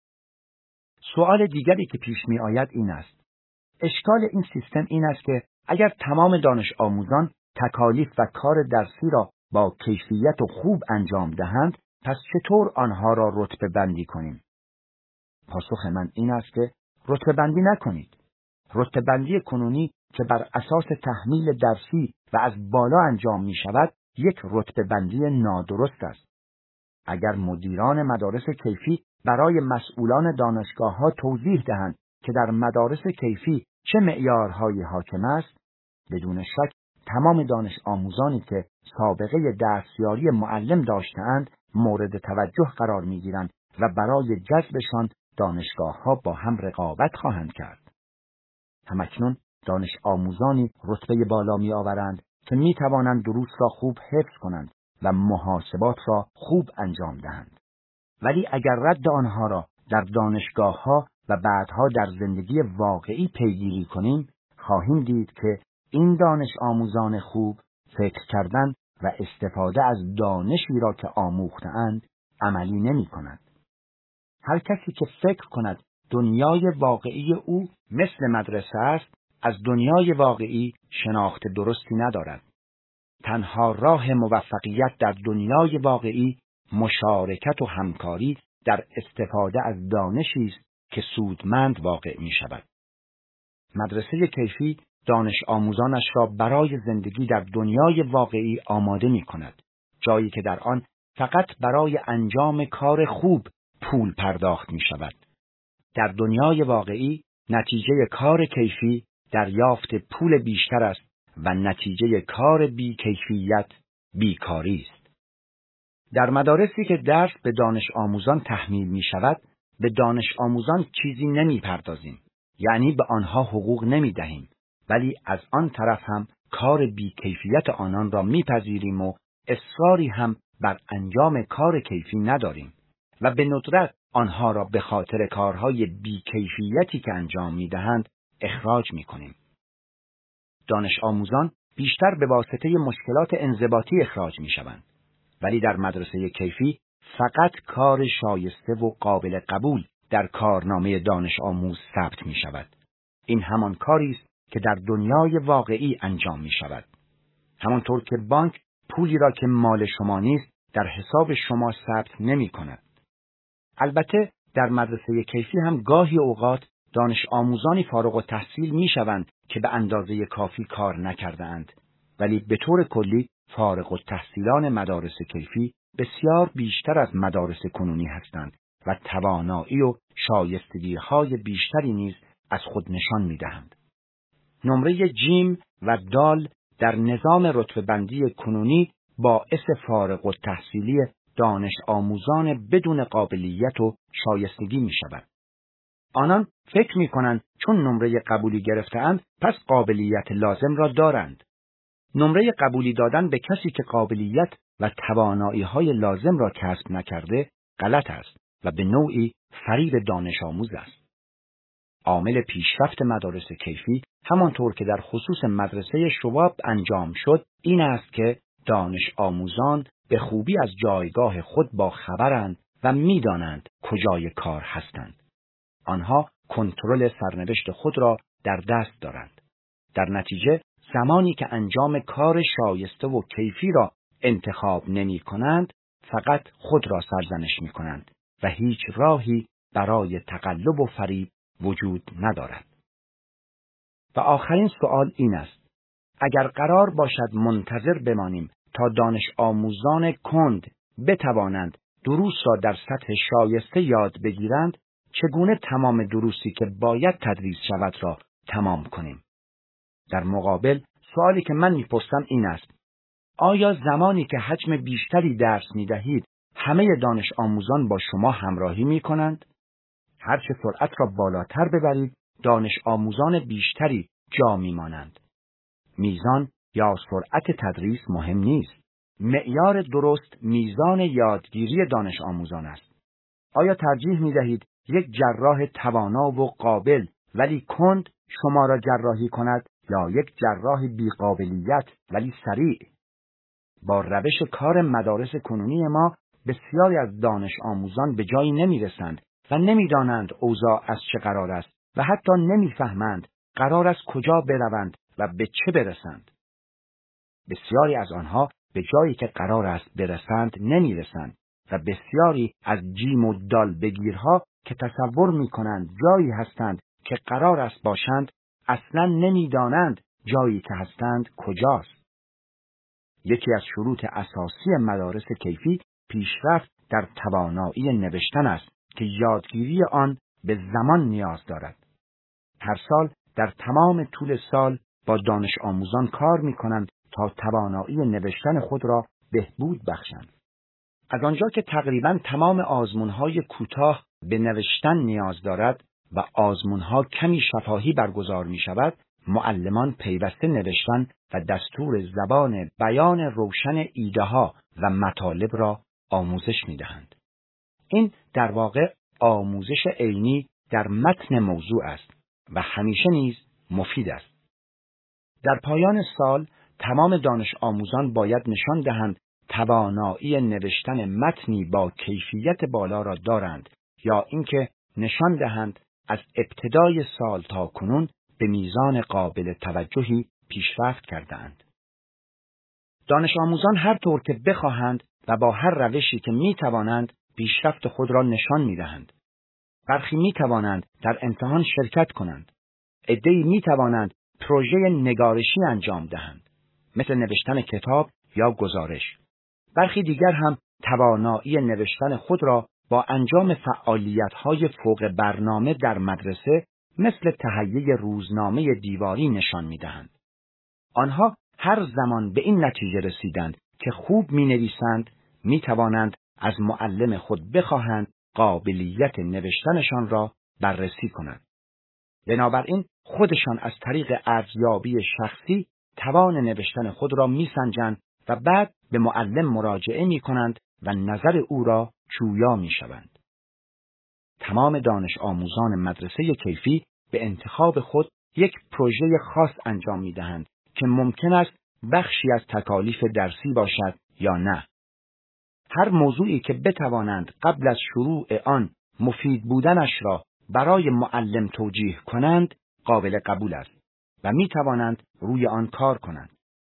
سوال دیگری که پیش می آید این است: اشکال این سیستم این است که اگر تمام دانش آموزان تکالیف و کار درسی را با کیفیت و خوب انجام دهند، پس چطور آنها را رتبه بندی کنیم؟ پاسخ من این است که رتبه بندی نکنید. رتبه بندی کنونی که بر اساس تحمیل درسی و از بالا انجام می شود، یک رتبه بندی نادرست است. اگر مدیران مدارس کیفی برای مسئولان دانشگاه ها توضیح دهند که در مدارس کیفی چه معیارهایی حاکم است، بدون شک تمام دانش آموزانی که سابقه دستیاری معلم داشته‌اند مورد توجه قرار می‌گیرند و برای جذبشان دانشگاه‌ها با هم رقابت خواهند کرد. همکنون دانش آموزانی رتبه بالا می‌آورند که می‌توانند دروس را خوب حفظ کنند و محاسبات را خوب انجام دهند. ولی اگر رد آنها را در دانشگاه‌ها و بعدها در زندگی واقعی پیگیری کنیم، خواهیم دید که این دانش آموزان خوب فکر کردن و استفاده از دانشی را که آموخته‌اند عملی نمی‌کنند. هر کسی که فکر کند دنیای واقعی او مثل مدرسه است، از دنیای واقعی شناخت درستی ندارد. تنها راه موفقیت در دنیای واقعی مشارکت و همکاری در استفاده از دانشی است که سودمند واقع می شود. مدرسه کیفی دانش آموزانش را برای زندگی در دنیای واقعی آماده می کند، جایی که در آن فقط برای انجام کار خوب پول پرداخت می شود. در دنیای واقعی نتیجه کار کیفی دریافت پول بیشتر است و نتیجه کار بی کیفیت بیکاری است. در مدارسی که درس به دانش آموزان تحمیل می شود، به دانش آموزان چیزی نمی پردازیم، یعنی به آنها حقوق نمی دهیم، ولی از آن طرف هم کار بی کیفیت آنان را می پذیریم و اصراری هم بر انجام کار کیفی نداریم و به ندرت آنها را به خاطر کارهای بی کیفیتی که انجام می دهند اخراج می کنیم. دانش آموزان بیشتر به واسطه مشکلات انضباطی اخراج می شوند، ولی در مدرسه کیفی فقط کار شایسته و قابل قبول در کارنامه دانش آموز ثبت می شود. این همان کاری است که در دنیای واقعی انجام می شود. همانطور که بانک پولی را که مال شما نیست در حساب شما ثبت نمی کند. البته در مدرسه کیفی هم گاهی اوقات دانش آموزانی فارغ التحصیل می شوند که به اندازه کافی کار نکرده اند، ولی به طور کلی فارغ التحصیلان مدارس کیفی بسیار بیشتر از مدارس کنونی هستند و توانایی و شایستگی‌های بیشتری نیز از خود نشان می‌دهند. نمره جیم و دال در نظام رتبه‌بندی کنونی باعث فارغ التحصیلی دانش آموزان بدون قابلیت و شایستگی می‌شود. آنان فکر می‌کنند چون نمره قبولی گرفته‌اند پس قابلیت لازم را دارند. نمره قبولی دادن به کسی که قابلیت و توانایی‌های لازم را کسب نکرده غلط است و به نوعی فریب دانش آموز است. عامل پیشرفت مدارس کیفی همانطور که در خصوص مدرسه شواب انجام شد این است که دانش آموزان به خوبی از جایگاه خود با خبرند و می‌دانند کجای کار هستند. آنها کنترل سرنوشت خود را در دست دارند. در نتیجه زمانی که انجام کار شایسته و کیفی را انتخاب نمی کنند، فقط خود را سرزنش می کنند و هیچ راهی برای تقلب و فریب وجود ندارد. و آخرین سوال این است: اگر قرار باشد منتظر بمانیم تا دانش آموزان کند بتوانند دروس را در سطح شایسته یاد بگیرند، چگونه تمام دروسی که باید تدریس شود را تمام کنیم؟ در مقابل سوالی که من میپرسم این است: آیا زمانی که حجم بیشتری درس میدهید همه دانش آموزان با شما همراهی میکنند؟ هرچه سرعت را بالاتر ببرید دانش آموزان بیشتری جا میمانند. میزان یا سرعت تدریس مهم نیست. معیار درست میزان یادگیری دانش آموزان است. آیا ترجیح میدهید یک جراح توانا و قابل ولی کند شما را جراحی کند یا یک جراح بی‌قابلیت ولی سریع؟ با روش کار مدارس کنونی ما بسیاری از دانش آموزان به جایی نمیرسند و نمیدانند اوضاع از چه قرار است و حتی نمیفهمند قرار است کجا بروند و به چه برسند. بسیاری از آنها به جایی که قرار است برسند نمیرسند و بسیاری از جیم و دال بگیرها که تصور میکنند جایی هستند که قرار است باشند اصلا نمیدانند جایی که هستند کجاست. یکی از شروط اساسی مدارس کیفی پیشرفت در توانایی نوشتن است که یادگیری آن به زمان نیاز دارد. هر سال در تمام طول سال با دانش آموزان کار می کنند تا توانایی نوشتن خود را بهبود بخشند. از آنجا که تقریباً تمام آزمون‌های کوتاه به نوشتن نیاز دارد و آزمون‌ها کمی شفاهی برگزار می‌شود، معلمان پیوسته نوشتن و دستور زبان بیان روشن ایده‌ها و مطالب را آموزش می‌دهند. این در واقع آموزش عینی در متن موضوع است و همیشه نیز مفید است. در پایان سال تمام دانش آموزان باید نشان دهند توانایی نوشتن متنی با کیفیت بالا را دارند یا اینکه نشان دهند از ابتدای سال تا کنون به میزان قابل توجهی پیشرفت کردند. دانش آموزان هر طور که بخواهند و با هر روشی که می توانند پیشرفت خود را نشان می دهند. برخی می توانند در امتحان شرکت کنند. عده‌ای می توانند پروژه نگارشی انجام دهند، مثل نوشتن کتاب یا گزارش. برخی دیگر هم توانایی نوشتن خود را با انجام فعالیت‌های فوق برنامه در مدرسه مثل تهیه روزنامه دیواری نشان می‌دهند. آنها هر زمان به این نتیجه رسیدند که خوب می‌نویسند، می‌توانند از معلم خود بخواهند قابلیت نوشتنشان را بررسی کنند. بنابراین خودشان از طریق ارزیابی شخصی توان نوشتن خود را می‌سنجند و بعد به معلم مراجعه می‌کنند و نظر او را جویا می‌شوند. تمام دانش آموزان مدرسه کیفی به انتخاب خود یک پروژه خاص انجام می‌دهند که ممکن است بخشی از تکالیف درسی باشد یا نه. هر موضوعی که بتوانند قبل از شروع آن مفید بودنش را برای معلم توجیه کنند قابل قبول است و می‌توانند روی آن کار کنند.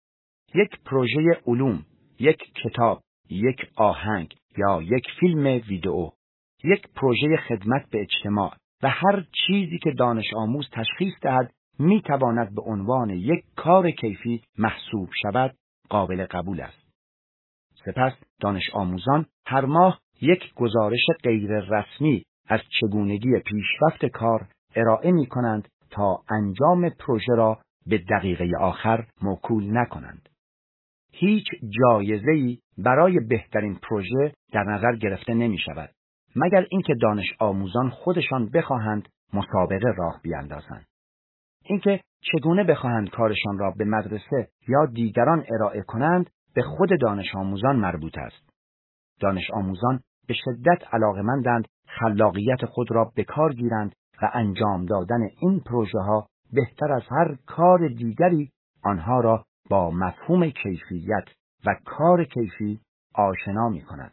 یک پروژه علوم، یک کتاب، یک آهنگ یا یک فیلم ویدئو، یک پروژه خدمت به اجتماع و هر چیزی که دانش آموز تشخیص دهد می‌تواند به عنوان یک کار کیفی محسوب شود قابل قبول است. سپس دانش آموزان هر ماه یک گزارش غیر رسمی از چگونگی پیشرفت کار ارائه می‌کنند تا انجام پروژه را به دقیقه آخر موکول نکنند. هیچ جایزه‌ای برای بهترین پروژه در نظر گرفته نمی‌شود مگر اینکه دانش آموزان خودشان بخواهند مسابقه راه بیاندازند. اینکه چگونه بخواهند کارشان را به مدرسه یا دیگران ارائه کنند به خود دانش آموزان مربوط است. دانش آموزان به شدت علاقه‌مندند خلاقیت خود را به کار گیرند و انجام دادن این پروژه ها بهتر از هر کار دیگری آنها را با مفهوم کیفیت و کار کیفی آشنا می کند.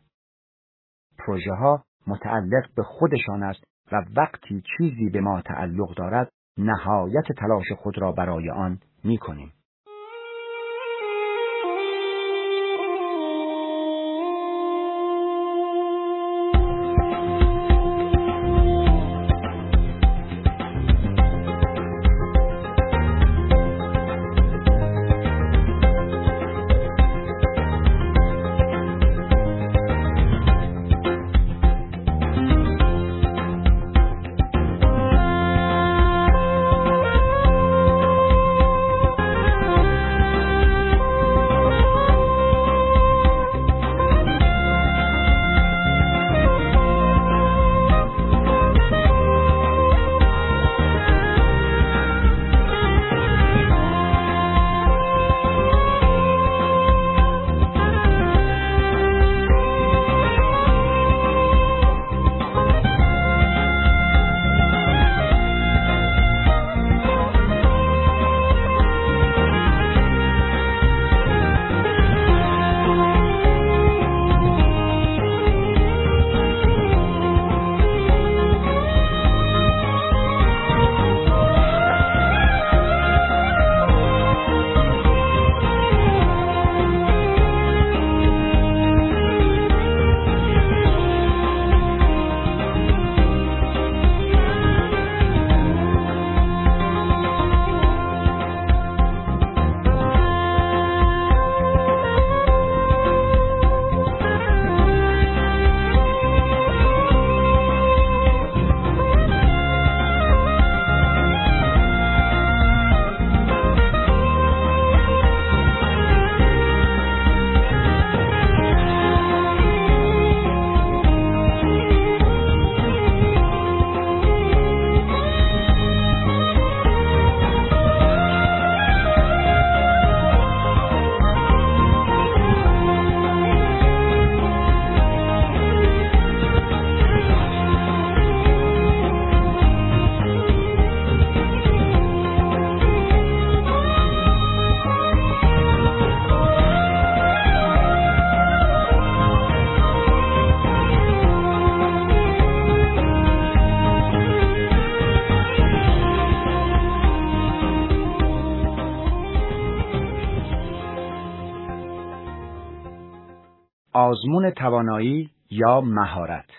پروژه ها متعلق به خودشان است و وقتی چیزی به ما تعلق دارد نهایت تلاش خود را برای آن می کنیم. آزمون توانایی یا مهارت.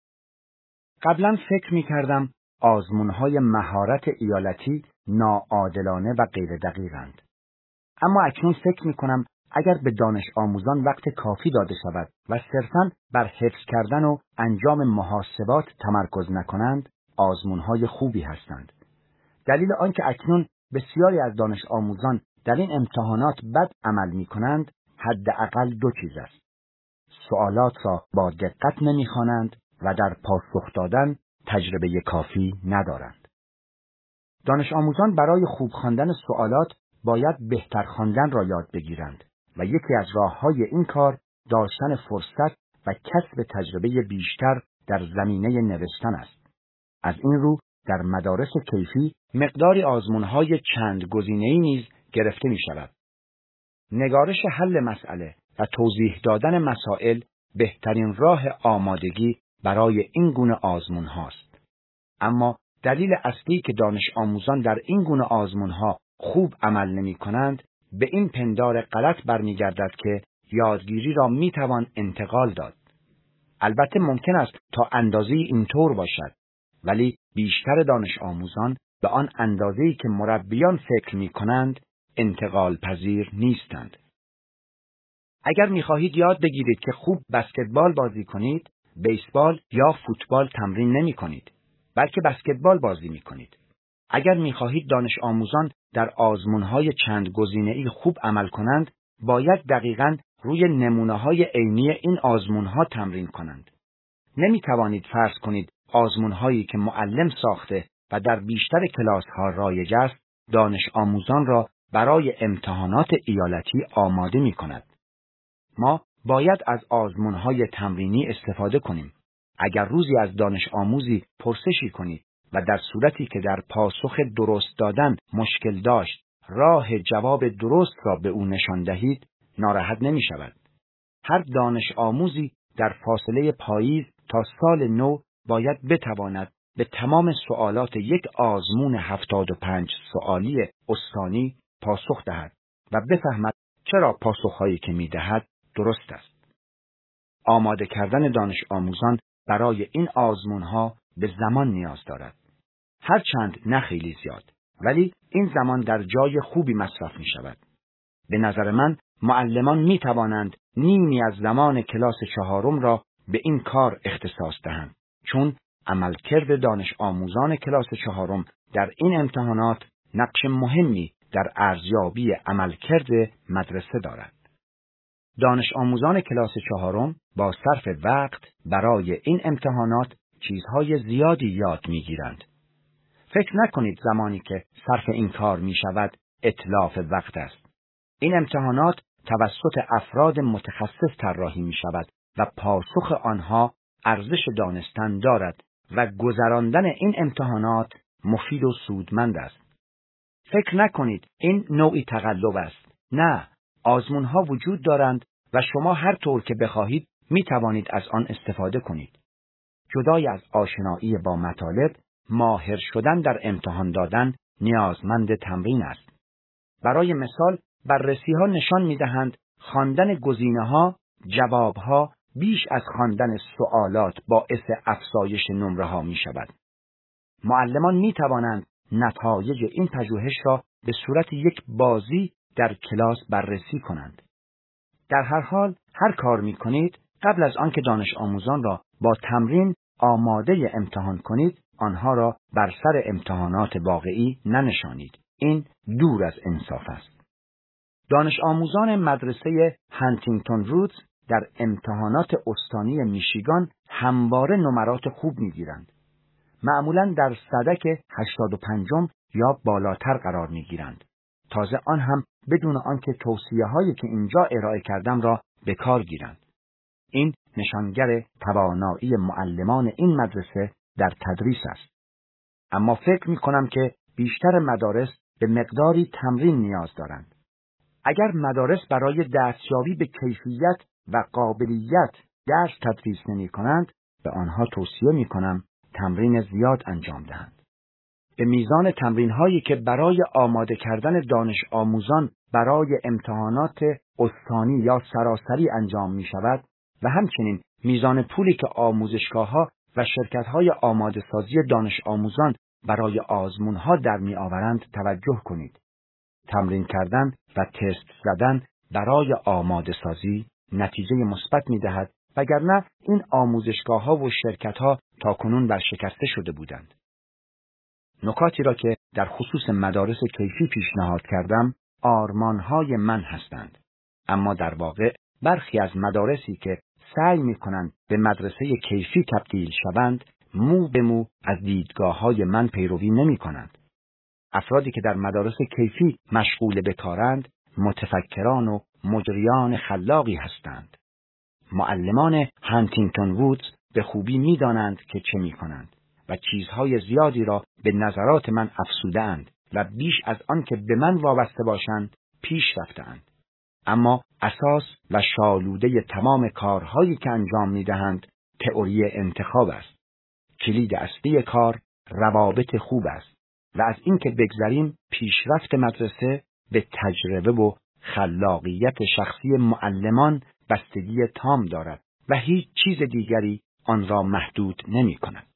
قبلا فکر می کردم آزمون‌های مهارت ایالتی ناعادلانه و غیر دقیقند. اما اکنون فکر می کنم اگر به دانش آموزان وقت کافی داده شود و صرفاً بر حفظ کردن و انجام محاسبات تمرکز نکنند، آزمون‌های خوبی هستند. دلیل آنکه اکنون بسیاری از دانش آموزان در این امتحانات بد عمل می کنند، حداقل دو چیز است. سوالات را با دقت نمی‌خوانند و در پاسخ دادن تجربه کافی ندارند. دانش آموزان برای خوب خواندن سوالات باید بهتر خواندن را یاد بگیرند و یکی از راه‌های این کار داشتن فرصت و کسب تجربه بیشتر در زمینه نوشتن است. از این رو در مدارس کیفی مقداری آزمون‌های چند گزینه‌ای نیز گرفته می‌شود. نگارش حل مسئله و توضیح دادن مسائل بهترین راه آمادگی برای این گونه آزمون هاست. اما دلیل اصلی که دانش آموزان در این گونه آزمون ها خوب عمل نمی کنند به این پندار غلط برمیگردد که یادگیری را می توان انتقال داد. البته ممکن است تا اندازه‌ای اینطور باشد، ولی بیشتر دانش آموزان به آن اندازه‌ای که مربیان فکر می کنند انتقال پذیر نیستند. اگر می‌خواهید یاد بگیرید که خوب بسکتبال بازی کنید، بیسبال یا فوتبال تمرین نمی‌کنید، بلکه بسکتبال بازی می‌کنید. اگر می‌خواهید دانش آموزان در آزمون‌های چند گزینه‌ای خوب عمل کنند، باید دقیقاً روی نمونه‌های عینی این آزمون‌ها تمرین کنند. نمی‌توانید فرض کنید آزمون‌هایی که معلم ساخته و در بیشتر کلاس‌ها رایج است، دانش آموزان را برای امتحانات ایالتی آماده می‌کند. ما باید از آزمون‌های تمرینی استفاده کنیم. اگر روزی از دانش آموزی پرسشی کنید و در صورتی که در پاسخ درست دادن مشکل داشت، راه جواب درست را به او نشان دهید، ناراحت نمی‌شود. هر دانش آموزی در فاصله پاییز تا سال نو باید بتواند به تمام سوالات یک آزمون هفتاد و پنج سوالی استانی پاسخ دهد و بفهمد چرا پاسخ‌هایی که می‌دهد درست است. آماده کردن دانش آموزان برای این آزمون‌ها به زمان نیاز دارد. هرچند نه خیلی زیاد، ولی این زمان در جای خوبی مصرف می‌شود. به نظر من معلمان می‌توانند نیمی از زمان کلاس چهارم را به این کار اختصاص دهند، چون عملکرد دانش آموزان کلاس چهارم در این امتحانات نقش مهمی در ارزیابی عملکرد مدرسه دارد. دانش آموزان کلاس چهارم با صرف وقت برای این امتحانات چیزهای زیادی یاد می‌گیرند. فکر نکنید زمانی که صرف این کار می‌شود اتلاف وقت است. این امتحانات توسط افراد متخصص طراحی می‌شود و پاسخ آنها ارزش دانستن دارد و گذراندن این امتحانات مفید و سودمند است. فکر نکنید این نوعی تقلب است. نه، آزمون‌ها وجود دارند و شما هر طور که بخواهید می توانید از آن استفاده کنید. جدای از آشنایی با مطالب، ماهر شدن در امتحان دادن نیازمند تمرین است. برای مثال، بررسی‌ها نشان می‌دهند خواندن گزینه‌ها، جواب‌ها بیش از خواندن سوالات باعث افزایش نمره‌ها می‌شود. معلمان می‌توانند نتایج این پژوهش را به صورت یک بازی در کلاس بررسی کنند. در هر حال هر کار می‌کنید قبل از آنکه دانش آموزان را با تمرین آماده امتحان کنید، آنها را بر سر امتحانات واقعی ننشانید. این دور از انصاف است. دانش آموزان مدرسه هانتینگتون رودز در امتحانات استانی میشیگان همواره نمرات خوب می‌گیرند. معمولاً در سدک هشتاد و پنجم یا بالاتر قرار می‌گیرند. تازه آن هم بدون آنکه توصیه‌هایی که اینجا ارائه کردم را به کار گیرند. این نشانگر توانایی معلمان این مدرسه در تدریس است. اما فکر می‌کنم که بیشتر مدارس به مقداری تمرین نیاز دارند. اگر مدارس برای دستیابی به کیفیت و قابلیت درس تدریس نمی‌کنند، به آنها توصیه می‌کنم تمرین زیاد انجام دهند. به میزان تمرین‌هایی که برای آماده کردن دانش آموزان برای امتحانات استانی یا سراسری انجام می‌شود، و همچنین میزان پولی که آموزشگاه‌ها و شرکت‌های آماده‌سازی دانش آموزان برای آزمون‌ها در می‌آورند توجه کنید. تمرین کردن و تست زدن برای آماده‌سازی نتیجه مثبت می‌دهد، وگرنه این آموزشگاه‌ها و شرکت‌ها تاکنون ورشکسته شده بودند. نکاتی را که در خصوص مدارس کیفی پیشنهاد کردم آرمان‌های من هستند، اما در واقع برخی از مدارسی که سعی می‌کنند به مدرسه کیفی تبدیل شوند مو به مو از دیدگاه‌های من پیروی نمی‌کنند. افرادی که در مدارس کیفی مشغول به کارند متفکران و مجریان خلاقی هستند. معلمان هانتینگتون وودز به خوبی می‌دانند که چه می‌کنند و چیزهای زیادی را به نظرات من افزوده‌اند و بیش از آن که به من وابسته باشند پیش رفته‌اند. اما اساس و شالوده تمام کارهایی که انجام می‌دهند تئوری انتخاب است. کلید اصلی کار روابط خوب است و از اینکه بگذریم پیشرفت مدرسه به تجربه و خلاقیت شخصی معلمان بستگی تام دارد و هیچ چیز دیگری آن را محدود نمی‌کند.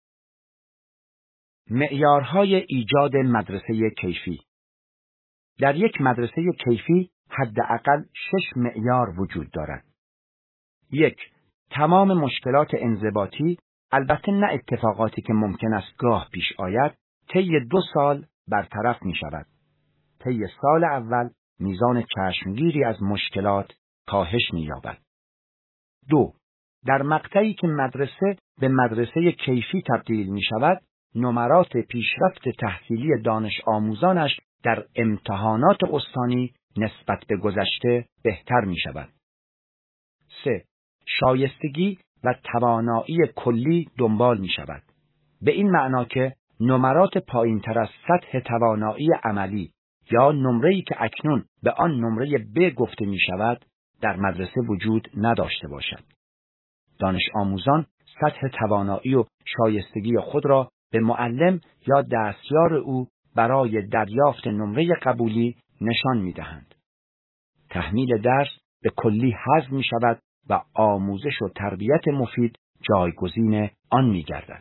معیارهای ایجاد مدرسه کیفی. در یک مدرسه کیفی حداقل شش معیار وجود دارد. یک، تمام مشکلات انضباطی، البته نه اتفاقاتی که ممکن است گاه پیش آید، طی دو سال برطرف می شود. طی سال اول میزان چشمگیری از مشکلات کاهش می یابد. دو، در مقطعی که مدرسه به مدرسه کیفی تبدیل می شود، نمرات پیشرفت تحصیلی دانش آموزانش در امتحانات استانی نسبت به گذشته بهتر می شود. سه، شایستگی و توانایی کلی دنبال می شود. به این معنا که نمرات پایین تر از سطح توانایی عملی یا نمره‌ای که اکنون به آن نمره ب گفته می شود در مدرسه وجود نداشته باشد. دانش آموزان سطح توانایی و شایستگی خود را به معلم یا دستیار او برای دریافت نمره قبولی نشان می دهند. تحمیل درس به کلی حذف می شود و آموزش و تربیت مفید جایگزین آن می گردد.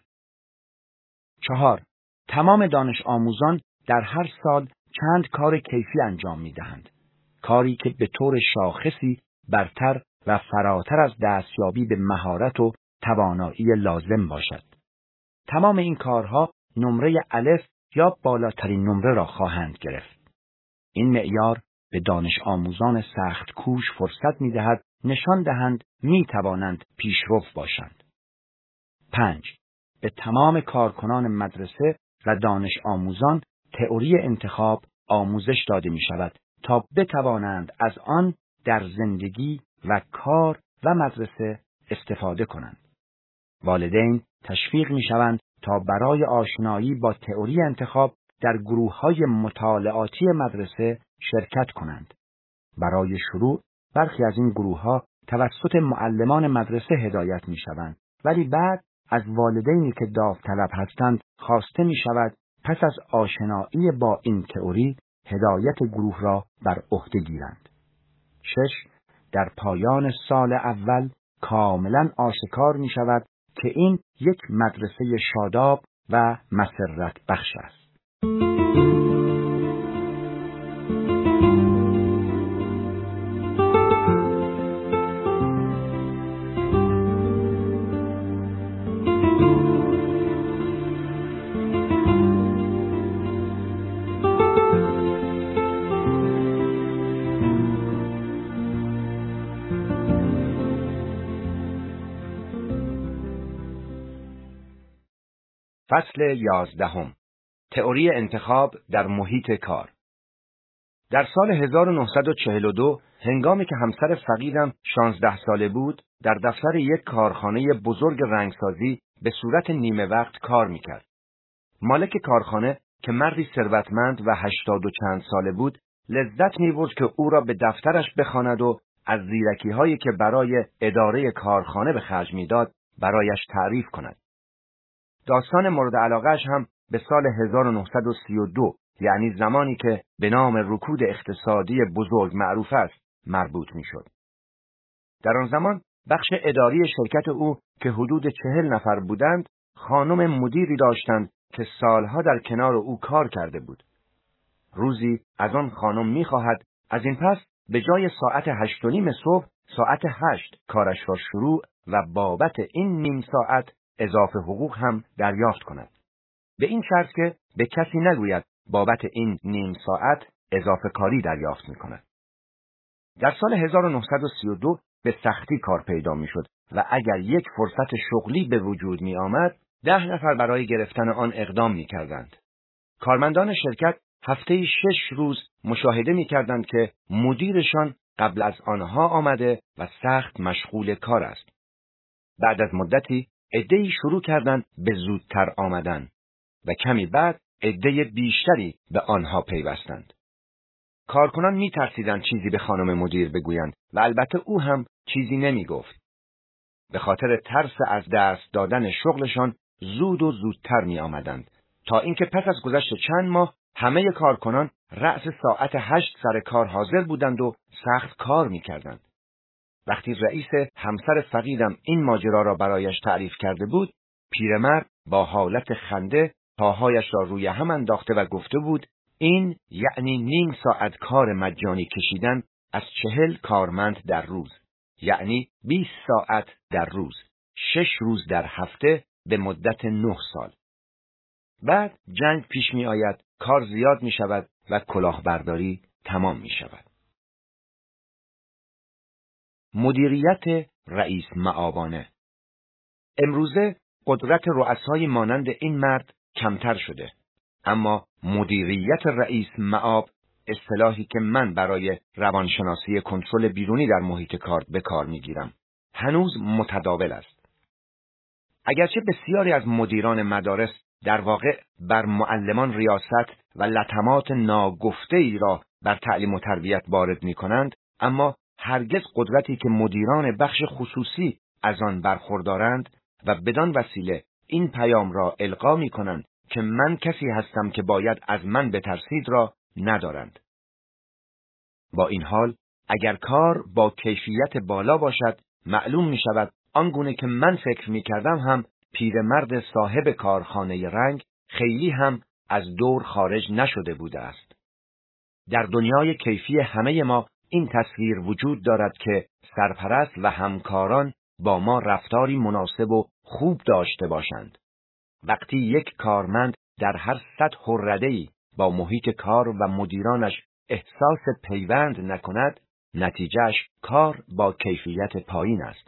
چهار، تمام دانش آموزان در هر سال چند کار کیفی انجام می دهند. کاری که به طور شاخصی برتر و فراتر از دستیابی به مهارت و توانایی لازم باشد. تمام این کارها نمره الف یا بالاترین نمره را خواهند گرفت. این معیار به دانش آموزان سخت کوش فرصت می دهد نشان دهند می توانند پیشرو باشند. پنج، به تمام کارکنان مدرسه و دانش آموزان تئوری انتخاب آموزش داده می شود تا بتوانند از آن در زندگی و کار و مدرسه استفاده کنند. والدین تشویق می شوند تا برای آشنایی با تئوری انتخاب در گروه‌های مطالعاتی مدرسه شرکت کنند. برای شروع برخی از این گروه‌ها توسط معلمان مدرسه هدایت می شوند، ولی بعد از والدینی که داوطلب هستند خواسته می شود پس از آشنایی با این تئوری هدایت گروه را بر عهده گیرند. شش، در پایان سال اول کاملا آشکار می شود که این یک مدرسه شاداب و مسرت بخش است. فصل یازدهم. تئوری انتخاب در محیط کار. در سال هزار و نهصد و چهل و دو هنگامی که همسر فقیدم شانزده ساله بود، در دفتر یک کارخانه بزرگ رنگسازی به صورت نیمه وقت کار میکرد. مالک کارخانه که مردی ثروتمند و هشتاد و چند ساله بود، لذت می‌برد که او را به دفترش بخواند و از زیرکی‌هایی که برای اداره کارخانه به خرج می‌داد برایش تعریف کند. داستان مورد علاقه‌اش هم به سال هزار و نهصد و سی و دو، یعنی زمانی که به نام رکود اقتصادی بزرگ معروف است، مربوط می‌شد. در آن زمان بخش اداری شرکت او که حدود چهل نفر بودند، خانم مدیری داشتند که سالها در کنار او کار کرده بود. روزی از آن خانم می‌خواهد از این پس به جای ساعت هشت و نیم صبح ساعت هشت کارش را شروع و بابت این نیم ساعت اضافه حقوق هم دریافت کند. به این شرط که به کسی نگوید بابت این نیم ساعت اضافه کاری دریافت می‌کند. در سال هزار و نهصد و سی و دو به سختی کار پیدا می‌شد و اگر یک فرصت شغلی به وجود می‌آمد، ده نفر برای گرفتن آن اقدام می‌کردند. کارمندان شرکت هفته‌ای شش روز مشاهده می‌کردند که مدیرشان قبل از آنها آمده و سخت مشغول کار است. بعد از مدتی عده‌ای شروع کردند به زودتر آمدن و کمی بعد عده بیشتری به آنها پیوستند. کارکنان می‌ترسیدند چیزی به خانم مدیر بگویند و البته او هم چیزی نمی‌گفت. به خاطر ترس از دست دادن شغلشان زود و زودتر می‌آمدند تا اینکه پس از گذشت چند ماه همه کارکنان رأس ساعت هشت سر کار حاضر بودند و سخت کار می‌کردند. وقتی رئیس همسر فقیدم این ماجرا را برایش تعریف کرده بود، پیرمرد با حالت خنده پاهایش را روی هم انداخته و گفته بود این یعنی نیم ساعت کار مجانی کشیدن از چهل کارمند در روز، یعنی بیست ساعت در روز، شش روز در هفته به مدت نه سال. بعد جنگ پیش می آید، کار زیاد می شود و کلاهبرداری تمام می شود. مدیریت رئیس معابانه. امروزه قدرت رؤسای مانند این مرد کمتر شده، اما مدیریت رئیس معاب، اصطلاحی که من برای روانشناسی کنترل بیرونی در محیط کار به کار میگیرم، هنوز متداول است. اگرچه بسیاری از مدیران مدارس در واقع بر معلمان ریاست و لطمات ناگفته ای را بر تعلیم و تربیت وارد می کنند، اما هرگز قدرتی که مدیران بخش خصوصی از آن برخوردارند و بدان وسیله این پیام را القا می کنند که من کسی هستم که باید از من بترسید را ندارند. با این حال اگر کار با کیفیت بالا باشد، معلوم می شود آنگونه که من فکر می کردم هم پیرمرد صاحب کارخانه رنگ خیلی هم از دور خارج نشده بوده است. در دنیای کیفی همه ما این تصویر وجود دارد که سرپرست و همکاران با ما رفتاری مناسب و خوب داشته باشند. وقتی یک کارمند در هر سطح و رده‌ای با محیط کار و مدیرانش احساس پیوند نکند، نتیجهش کار با کیفیت پایین است.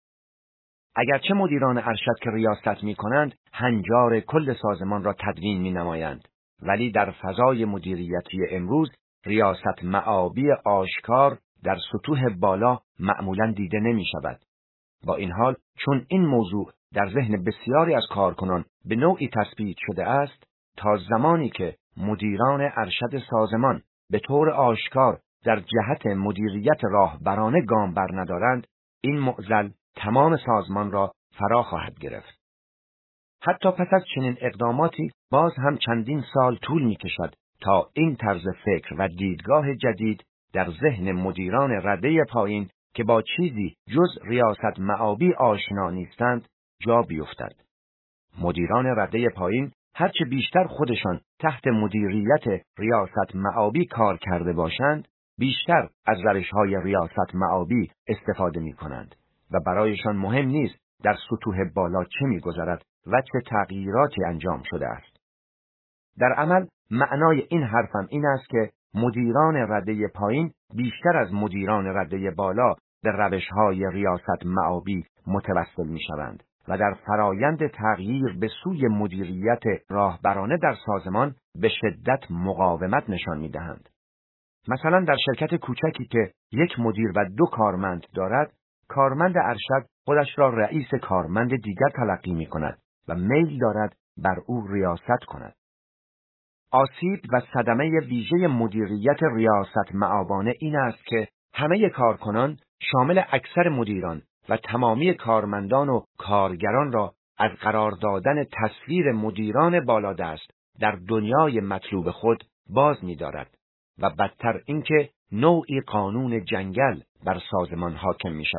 اگرچه مدیران ارشد که ریاست می کنند هنجار کل سازمان را تدوین می نمایند، ولی در فضای مدیریتی امروز ریاست معابی آشکار در سطوح بالا معمولاً دیده نمی شود. با این حال چون این موضوع در ذهن بسیاری از کارکنان به نوعی تثبیت شده است، تا زمانی که مدیران ارشد سازمان به طور آشکار در جهت مدیریت راهبرانه گام بر ندارند، این معضل تمام سازمان را فرا خواهد گرفت. حتی پس از چنین اقداماتی باز هم چندین سال طول می کشد تا این طرز فکر و دیدگاه جدید در ذهن مدیران رده پایین که با چیزی جز ریاست معابی آشنا نیستند جا بیفتد. مدیران رده پایین هرچه بیشتر خودشان تحت مدیریت ریاست معابی کار کرده باشند، بیشتر از روش‌های ریاست معابی استفاده می کنند و برایشان مهم نیست در سطوح بالا چه می گذرد و چه تغییراتی انجام شده است. در عمل معنای این حرفم این است که مدیران رده پایین بیشتر از مدیران رده بالا به روش‌های ریاست معابی متوسل می شوند و در فرایند تغییر به سوی مدیریت راهبرانه در سازمان به شدت مقاومت نشان می دهند. مثلا در شرکت کوچکی که یک مدیر و دو کارمند دارد، کارمند ارشد خودش را رئیس کارمند دیگر تلقی می کند و میل دارد بر او ریاست کند. آسیب و صدمه ویژه مدیریت ریاست معابانه این است که همه کارکنان شامل اکثر مدیران و تمامی کارمندان و کارگران را از قرار دادن تصویر مدیران بالادست در دنیای مطلوب خود باز می دارد و بدتر اینکه نوعی قانون جنگل بر سازمان حاکم می شود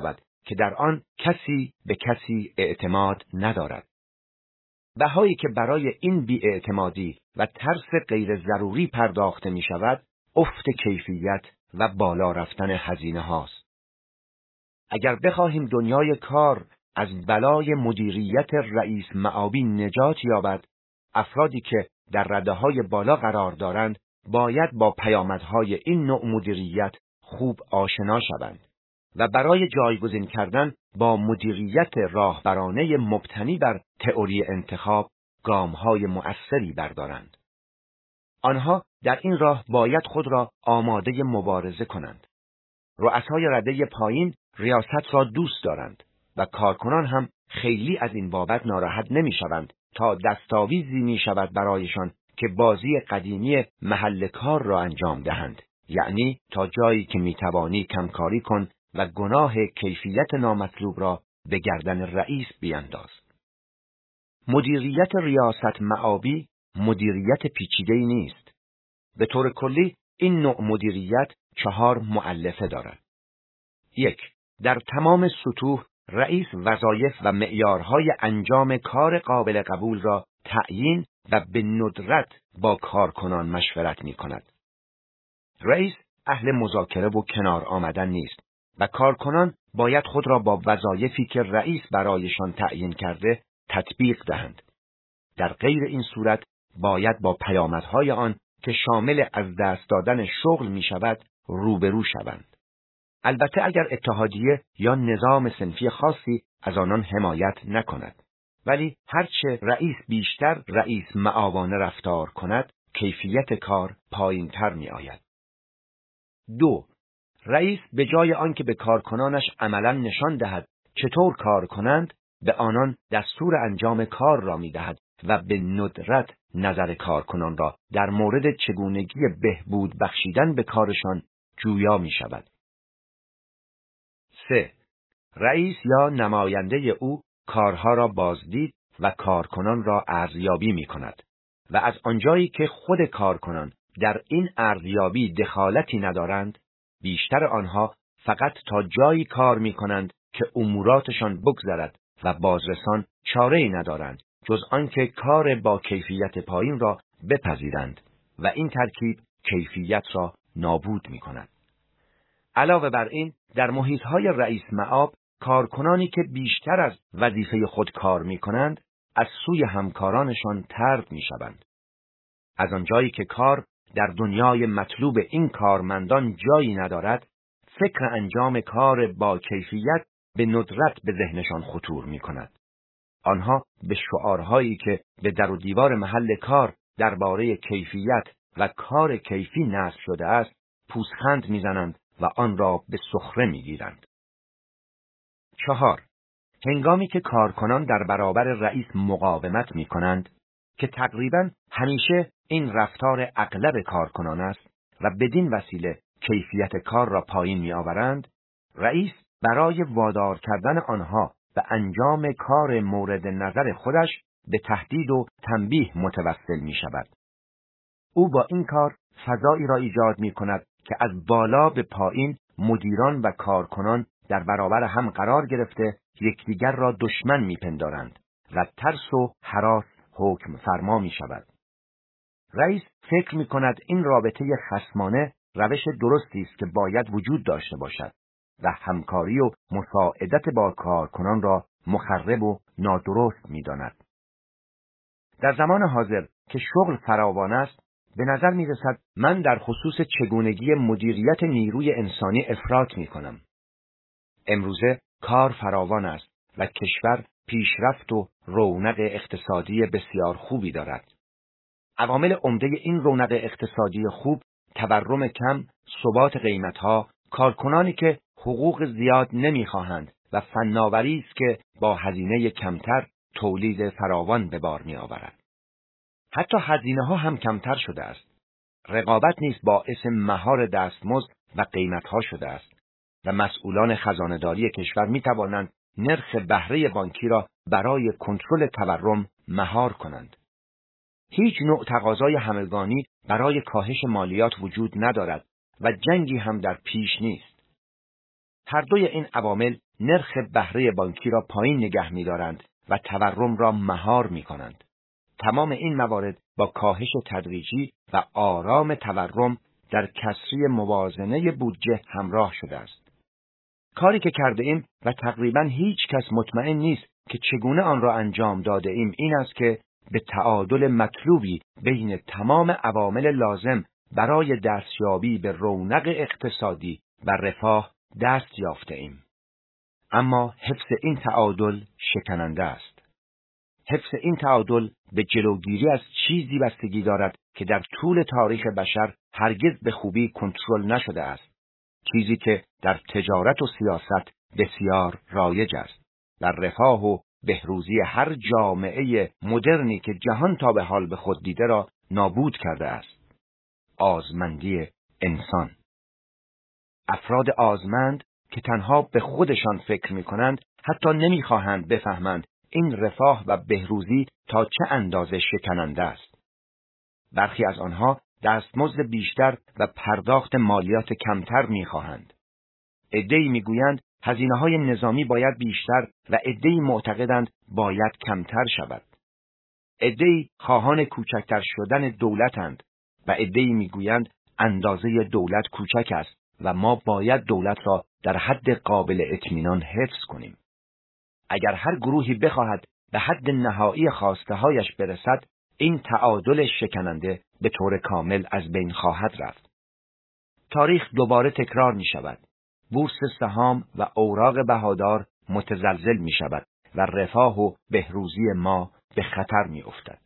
که در آن کسی به کسی اعتماد ندارد. بهایی که برای این بی‌اعتمادی و ترس غیر ضروری پرداخته می شود، افت کیفیت و بالا رفتن هزینه هاست. اگر بخواهیم دنیای کار از بلای مدیریت رئیس معابی نجات یابد، افرادی که در رده‌های بالا قرار دارند باید با پیامدهای این نوع مدیریت خوب آشنا شوند و برای جایگزین کردن با مدیریت راهبرانه مبتنی بر تئوری انتخاب گام‌های مؤثری بردارند. آنها در این راه باید خود را آماده مبارزه کنند. رؤسای رده پایین ریاست را دوست دارند و کارکنان هم خیلی از این بابت ناراحت نمی‌شوند تا دستاویزی می‌شود برایشان که بازی قدیمی محل کار را انجام دهند، یعنی تا جایی که می‌توانی کمکاری کن و گناه کیفیت نامطلوب را به گردن رئیس بیانداز. مدیریت ریاست معابی مدیریت پیچیده‌ای نیست. به طور کلی این نوع مدیریت چهار مؤلفه دارد. یک، در تمام سطوح رئیس وظایف و معیارهای انجام کار قابل قبول را تعیین و به ندرت با کارکنان مشورت می کند. رئیس اهل مذاکره و کنار آمدن نیست و کارکنان باید خود را با وظایفی که رئیس برایشان تعیین کرده تطبیق دهند. در غیر این صورت باید با پیامدهای آن که شامل از دست دادن شغل می شود روبرو شوند. البته اگر اتحادیه یا نظام صنفی خاصی از آنان حمایت نکند. ولی هرچه رئیس بیشتر رئیس معاوانه رفتار کند، کیفیت کار پایین تر می آید. دو، رئیس به جای آنکه به کارکنانش عملا نشان دهد چطور کار کنند، به آنان دستور انجام کار را می دهد و به ندرت نظر کارکنان را در مورد چگونگی بهبود بخشیدن به کارشان جویا می شود. سه، رئیس یا نماینده او کارها را بازدید و کارکنان را ارزیابی می کند و از آنجایی که خود کارکنان در این ارزیابی دخالتی ندارند، بیشتر آنها فقط تا جایی کار می کنند که اموراتشان بگذرد و بازرسان چاره‌ای ندارند جز آنکه کار با کیفیت پایین را بپذیرند و این ترکیب کیفیت را نابود می کند. علاوه بر این، در محیط‌های رئیس معاب کارکنانی که بیشتر از وظیفه خود کار می کنند از سوی همکارانشان طرد می شوند. از آنجایی که کار در دنیای مطلوب این کارمندان جایی ندارد، فکر انجام کار با کیفیت به ندرت به ذهنشان خطور می کند. آنها به شعارهایی که به در و دیوار محل کار درباره کیفیت و کار کیفی نصب شده است، پوزخند می‌زنند و آن را به سخره می‌گیرند. چهار، هنگامی که کارکنان در برابر رئیس مقاومت می‌کنند که تقریباً همیشه این رفتار اغلب کارکنان است و بدین وسیله کیفیت کار را پایین می‌آورند، رئیس برای وادار کردن آنها به انجام کار مورد نظر خودش به تهدید و تنبیه متوسل می‌شود. او با این کار فضایی را ایجاد می‌کند که از بالا به پایین مدیران و کارکنان در برابر هم قرار گرفته یکدیگر را دشمن می‌پندارند و ترس و هراس حکم فرما می‌شود. رئیس فکر می‌کند این رابطه خصمانه روش درستی است که باید وجود داشته باشد و همکاری و مساعدت با کارکنان را مخرب و نادرست می‌داند. در زمان حاضر که شغل فراوان است، به نظر می رسد من در خصوص چگونگی مدیریت نیروی انسانی افراط می کنم. امروزه کار فراوان است و کشور پیشرفت و رونق اقتصادی بسیار خوبی دارد. عوامل عمده این رونق اقتصادی خوب، تورم کم، ثبات قیمتها، کارکنانی که حقوق زیاد نمی خواهند و فناوری است که با هزینه کمتر تولید فراوان به بار می آورد. حتی هزینه ها هم کمتر شده است. رقابت نیز باعث مهار دستمزد و قیمت ها شده است و مسئولان خزانه‌داری کشور می توانند نرخ بهره بانکی را برای کنترل تورم مهار کنند. هیچ نوع تقاضای همگانی برای کاهش مالیات وجود ندارد و جنگی هم در پیش نیست. هر دوی این عوامل نرخ بهره بانکی را پایین نگه می‌دارند و تورم را مهار می‌کنند. تمام این موارد با کاهش تدریجی و آرام تورم در کسری موازنه بودجه همراه شده است. کاری که کرده ایم و تقریباً هیچ کس مطمئن نیست که چگونه آن را انجام داده ایم این است که به تعادل مطلوبی بین تمام عوامل لازم برای دستیابی به رونق اقتصادی و رفاه دست یافته ایم. اما حفظ این تعادل شکننده است. حفظ این تعادل به جلوگیری از چیزی بستگی دارد که در طول تاریخ بشر هرگز به خوبی کنترل نشده است. چیزی که در تجارت و سیاست بسیار رایج است. در رفاه و بهروزی هر جامعه مدرنی که جهان تا به حال به خود دیده را نابود کرده است. آزمندی انسان. افراد آزمند که تنها به خودشان فکر می کنند حتی نمی خواهند بفهمند این رفاه و بهروزی تا چه اندازه شکننده است. برخی از آنها دستمزد بیشتر و پرداخت مالیات کمتر می خواهند. عده‌ای می گویند هزینه‌های نظامی باید بیشتر و عده‌ای معتقدند باید کمتر شود. عده‌ای خواهان کوچکتر شدن دولتند و عده‌ای می گویند اندازه دولت کوچک است و ما باید دولت را در حد قابل اطمینان حفظ کنیم. اگر هر گروهی بخواهد به حد نهایی خواسته‌هایش برسد، این تعادل شکننده به طور کامل از بین خواهد رفت. تاریخ دوباره تکرار می شود. بورس سهام و اوراق بهادار متزلزل می شود و رفاه و بهروزی ما به خطر می افتد.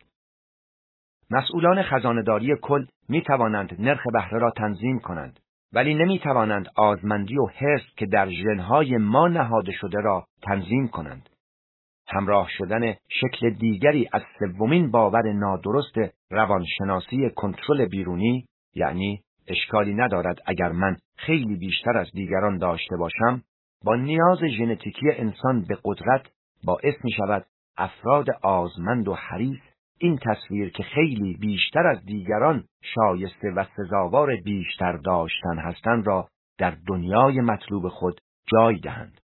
مسئولان خزانه‌داری کل می توانند نرخ بهره را تنظیم کنند، ولی نمی توانند آزمندی و حرص که در ژن‌های ما نهاده شده را تنظیم کنند. همراه شدن شکل دیگری از سومین باور نادرست روانشناسی کنترل بیرونی، یعنی اشکالی ندارد اگر من خیلی بیشتر از دیگران داشته باشم، با نیاز ژنتیکی انسان به قدرت باعث می شود افراد آزمند و حریص این تصویر که خیلی بیشتر از دیگران شایسته و سزاوار بیشتر داشتن هستند را در دنیای مطلوب خود جای دهند.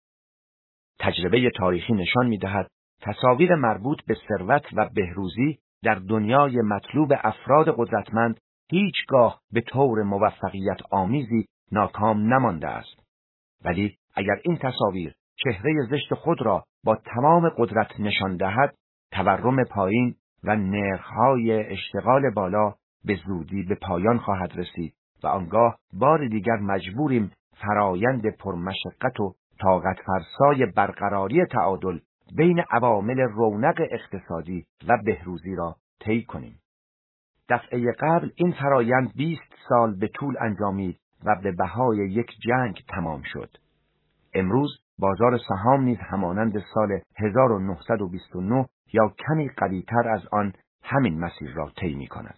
تجربه تاریخی نشان می‌دهد تصاویر مربوط به ثروت و بهروزی در دنیای مطلوب افراد قدرتمند هیچگاه به طور موفقیت آمیزی ناکام نمانده است. ولی اگر این تصاویر چهره زشت خود را با تمام قدرت نشان دهد، تورم پایین و نرخ‌های اشتغال بالا به زودی به پایان خواهد رسید و آنگاه بار دیگر مجبوریم فرایند پرمشقت و طاقت فرسای برقراری تعادل بین عوامل رونق اقتصادی و بهروزی را طی کنیم. دفعه قبل این فرایند بیست سال به طول انجامید و به بهای یک جنگ تمام شد. امروز بازار سهام نیز همانند سال هزار و نهصد و بیست و نه یا کمی قوی‌تر از آن همین مسیر را طی می‌کند.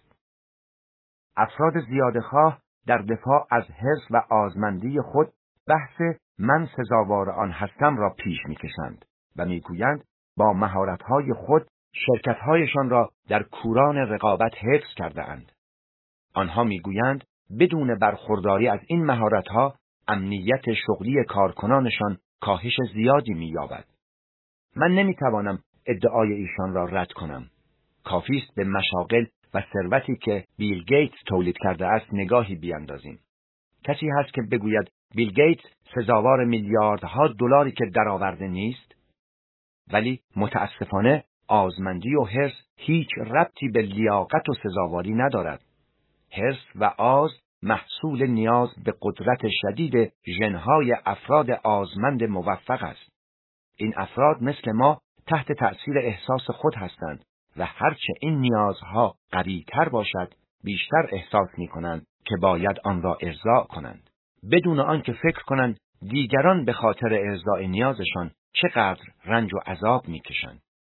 افراد زیادخواه در دفاع از حرص و آزمندی خود بحث من سزاوار آن هستم را پیش می‌کشند و می‌گویند با مهارت‌های خود شرکت‌هایشان را در کوران رقابت حفظ کرده‌اند. آنها می‌گویند بدون برخورداری از این مهارت‌ها امنیت شغلی کارکنانشان کاهش زیادی می‌یابد. من نمی‌توانم ادعای ایشان را رد کنم. کافی است به مشاغل و ثروتی که بیل گیتس تولید کرده است نگاهی بیاندازیم. کسی هست که بگوید بیل گیتس سزاوار میلیاردها دلاری که درآورده نیست؟ ولی متاسفانه آزمندی و حرص هیچ ربطی به لیاقت و سزاواری ندارد. حرص و آز محصول نیاز به قدرت شدید ژن‌های افراد آزمند موفق است. این افراد مثل ما تحت تأثیر احساس خود هستند و هرچه این نیازها قوی‌تر باشد بیشتر احساس می‌کنند که باید آن را ارضاء کنند، بدون آنکه فکر کنند دیگران به خاطر ارضاء نیازشان چقدر رنج و عذاب می‌کشند.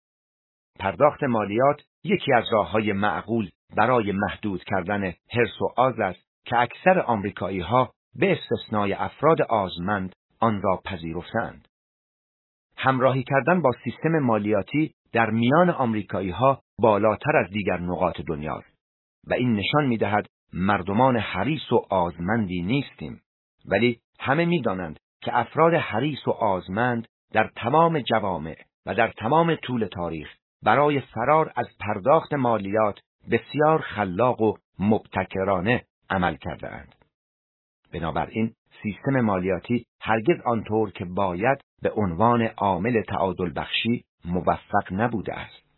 پرداخت مالیات یکی از راه‌های معقول برای محدود کردن حرص و آز است که اکثر آمریکایی‌ها به استثنای افراد آزمند آن را پذیرفتند. همراهی کردن با سیستم مالیاتی در میان آمریکایی‌ها بالاتر از دیگر نقاط دنیاست و این نشان می‌دهد مردمان حریص و آزمندی نیستیم، ولی همه می‌دانند که افراد حریص و آزمند در تمام جوامع و در تمام طول تاریخ برای فرار از پرداخت مالیات بسیار خلاق و مبتکرانه عمل کرده‌اند. بنابراین سیستم مالیاتی هرگز آنطور که باید به عنوان عامل تعادل بخشی موفق نبوده است.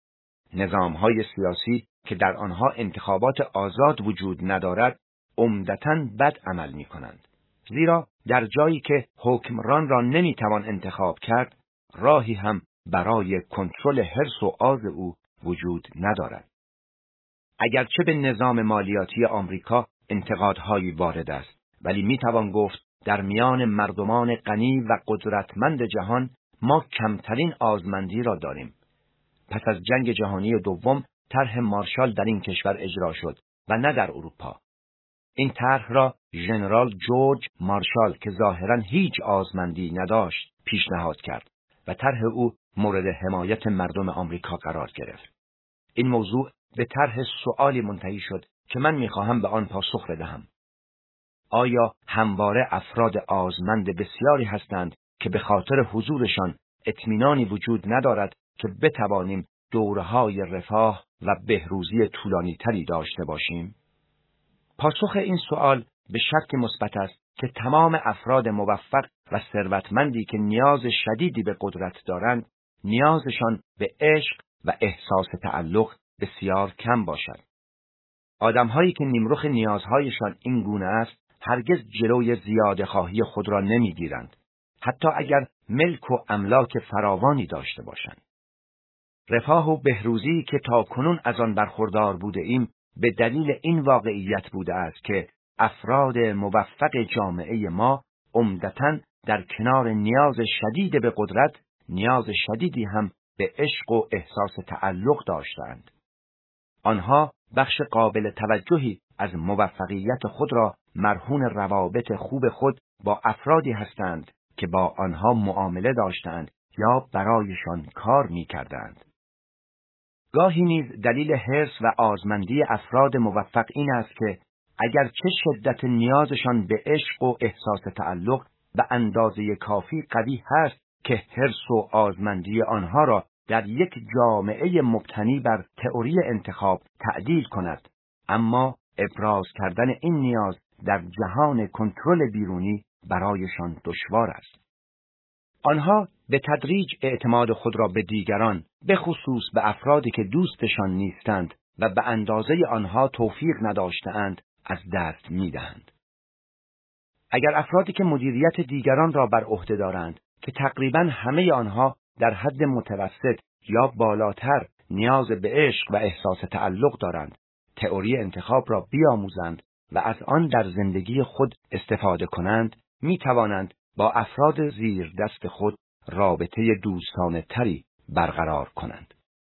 نظام‌های سیاسی که در آنها انتخابات آزاد وجود ندارد، عمدتاً بد عمل می‌کنند. زیرا در جایی که حکمران را نمی‌توان انتخاب کرد، راهی هم برای کنترل حرص و آز او وجود ندارد. اگرچه به نظام مالیاتی آمریکا انتقادهایی وارد است، ولی می‌توان گفت در میان مردمان غنی و قدرتمند جهان ما کمترین آزمندی را داریم. پس از جنگ جهانی دوم طرح مارشال در این کشور اجرا شد و نه در اروپا. این طرح را ژنرال جورج مارشال که ظاهراً هیچ آزمندی نداشت پیشنهاد کرد و طرح او مورد حمایت مردم آمریکا قرار گرفت. این موضوع به طرح سؤالی منتهی شد که من می‌خواهم به آن پاسخ بدهم. آیا همواره افراد آزمند بسیاری هستند که به خاطر حضورشان اطمینانی وجود ندارد که بتوانیم دوره‌های رفاه و بهروزی طولانی‌تری داشته باشیم؟ پاسخ این سؤال به شرط مثبت است که تمام افراد موفق و ثروتمندی که نیاز شدیدی به قدرت دارند، نیازشان به عشق و احساس تعلق بسیار کم باشد. آدم‌هایی که نیمرخ نیازهایشان این گونه است، هرگز جلوی زیاده خواهی خود را نمی‌گیرند، حتی اگر ملک و املاک فراوانی داشته باشند. رفاه و بهروزی که تاکنون از آن برخوردار بوده ایم، به دلیل این واقعیت بوده است که افراد موفق جامعه ما عمدتاً در کنار نیاز شدید به قدرت، نیاز شدیدی هم به عشق و احساس تعلق داشتند. آنها بخش قابل توجهی از موفقیت خود را مرهون روابط خوب خود با افرادی هستند که با آنها معامله داشتند یا برایشان کار می‌کردند. گاهی نیز دلیل حرص و آزمندی افراد موفق این است که اگر چه شدت نیازشان به عشق و احساس تعلق به اندازه کافی قوی هست که حرص و آزمندی آنها را در یک جامعه مبتنی بر تئوری انتخاب تعدیل کند، اما ابراز کردن این نیاز در جهان کنترل بیرونی برایشان دشوار است. آنها به تدریج اعتماد خود را به دیگران، به خصوص به افرادی که دوستشان نیستند و به اندازه آنها توفیق نداشته‌اند، از دست می‌دهند. اگر افرادی که مدیریت دیگران را بر عهده دارند، که تقریباً همه آنها در حد متوسط یا بالاتر نیاز به عشق و احساس تعلق دارند، تئوری انتخاب را بیاموزند و از آن در زندگی خود استفاده کنند، می توانند با افراد زیر دست خود رابطه دوستانه تری برقرار کنند.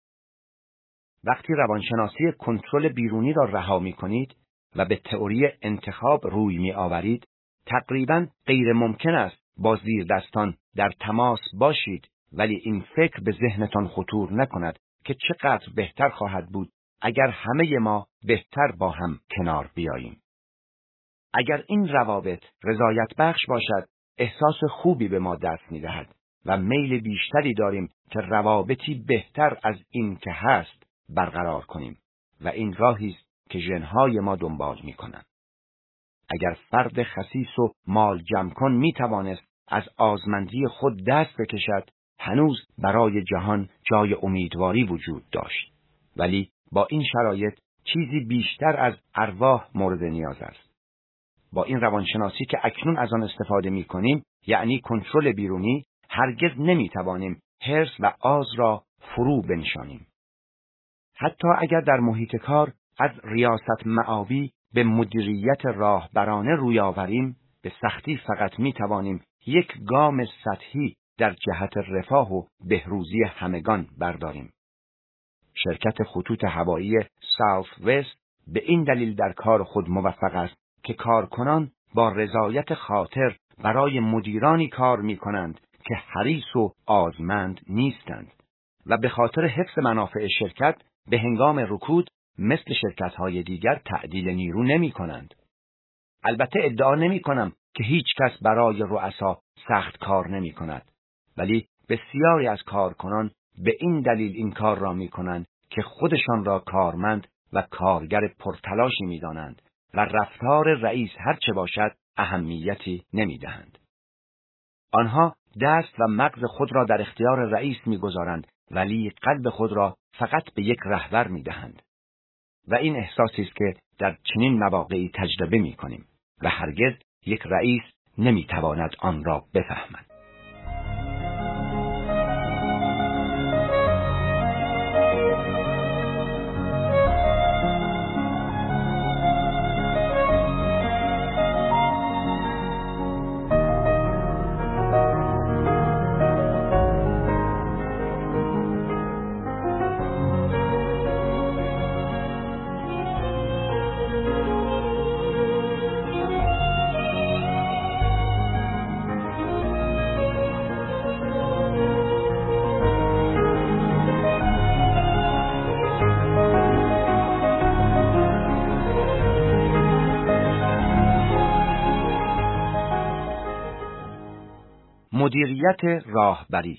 وقتی روانشناسی کنترل بیرونی را رها می کنید و به تئوری انتخاب روی می آورید، تقریباً غیر ممکن است با زیر دستان در تماس باشید، ولی این فکر به ذهنتان خطور نکند که چقدر بهتر خواهد بود اگر همه ما بهتر با هم کنار بیاییم. اگر این روابط رضایت بخش باشد، احساس خوبی به ما دست می دهد و میل بیشتری داریم که روابطی بهتر از این که هست برقرار کنیم و این راهی است که ژن‌های ما دنبال می کنند. اگر فرد خسیس و مال جمع کن می توانست از آزمندی خود دست بکشد، هنوز برای جهان جای امیدواری وجود داشت. ولی با این شرایط چیزی بیشتر از ارواح مورد نیاز است. با این روانشناسی که اکنون از آن استفاده می کنیم، یعنی کنترل بیرونی، هرگز نمی توانیم حرص و آز را فرو بنشانیم. حتی اگر در محیط کار از ریاست معابی به مدیریت راهبرانه روی آوریم، به سختی فقط می توانیم یک گام سطحی در جهت رفاه و بهروزی همگان برداریم. شرکت خطوط هوایی ساوث وست به این دلیل در کار خود موفق است که کارکنان با رضایت خاطر برای مدیرانی کار می کنند که حریص و آزمند نیستند و به خاطر حفظ منافع شرکت به هنگام رکود مثل شرکت‌های دیگر تعدیل نیرو نمی کنند. البته ادعا نمی کنم که هیچ کس برای رؤسا سخت کار نمی کند، ولی بسیاری از کارکنان به این دلیل این کار را می کنند که خودشان را کارمند و کارگر پرتلاشی می دانند و رفتار رئیس هرچه باشد اهمیتی نمی دهند. آنها دست و مغز خود را در اختیار رئیس می گذارند، ولی قلب خود را فقط به یک رهبر می دهند. و این احساسی است که در چنین مواقعی تجربه می کنیم و هرگز یک رئیس نمی تواند آن را بفهمد. مدیریت راهبری.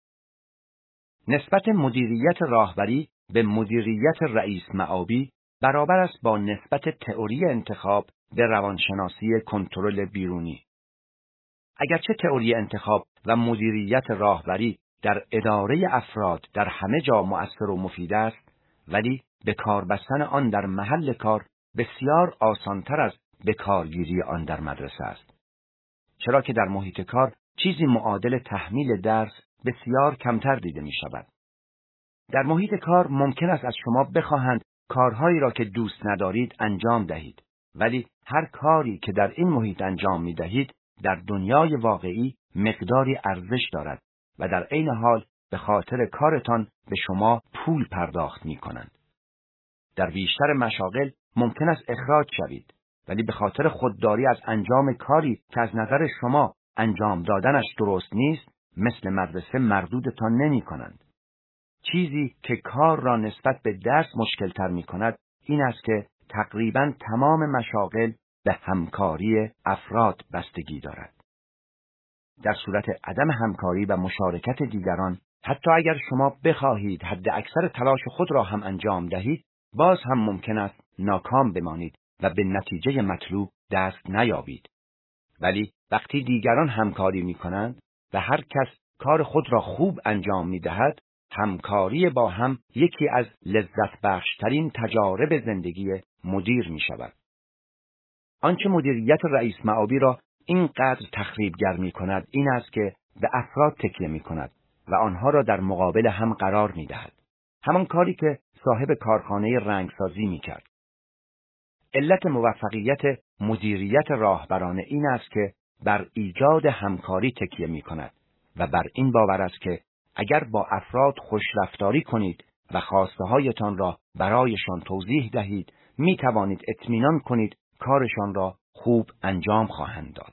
نسبت مدیریت راهبری به مدیریت رئیس معابی برابر است با نسبت تئوری انتخاب به روانشناسی کنترل بیرونی. اگرچه تئوری انتخاب و مدیریت راهبری در اداره افراد در همه جا مؤثر و مفید است، ولی به کار بستن آن در محل کار بسیار آسانتر از به کارگیری آن در مدرسه است. چرا که در محیط کار چیزی معادل تحمیل درس بسیار کمتر دیده می شود. در محیط کار ممکن است از شما بخواهند کارهایی را که دوست ندارید انجام دهید، ولی هر کاری که در این محیط انجام می دهید در دنیای واقعی مقداری ارزش دارد و در عین حال به خاطر کارتان به شما پول پرداخت می کنند. در بیشتر مشاغل ممکن است اخراج شوید، ولی به خاطر خودداری از انجام کاری که از نظر شما انجام دادنش درست نیست، مثل مدرسه مردودتان نمی کنند. چیزی که کار را نسبت به درس مشکل تر می کند این است که تقریباً تمام مشاغل به همکاری افراد بستگی دارد. در صورت عدم همکاری و مشارکت دیگران، حتی اگر شما بخواهید حد اکثر تلاش خود را هم انجام دهید، باز هم ممکن است ناکام بمانید و به نتیجه مطلوب دست نیابید. ولی وقتی دیگران همکاری می کنند و هر کس کار خود را خوب انجام می دهد، همکاری با هم یکی از لذت بخشترین تجارب زندگی مدیر می شود. آنچه مدیریت رئیس معابی را اینقدر تخریبگر می کند این است که به افراد تکیه می کند و آنها را در مقابل هم قرار می دهد. همان کاری که صاحب کارخانه رنگسازی می کرد. علت موفقیت مدیریت راهبرانه این است که بر ایجاد همکاری تکیه می کند و بر این باور است که اگر با افراد خوش رفتاری کنید و خواسته هایتان را برایشان توضیح دهید، می توانید اطمینان کنید کارشان را خوب انجام خواهند داد.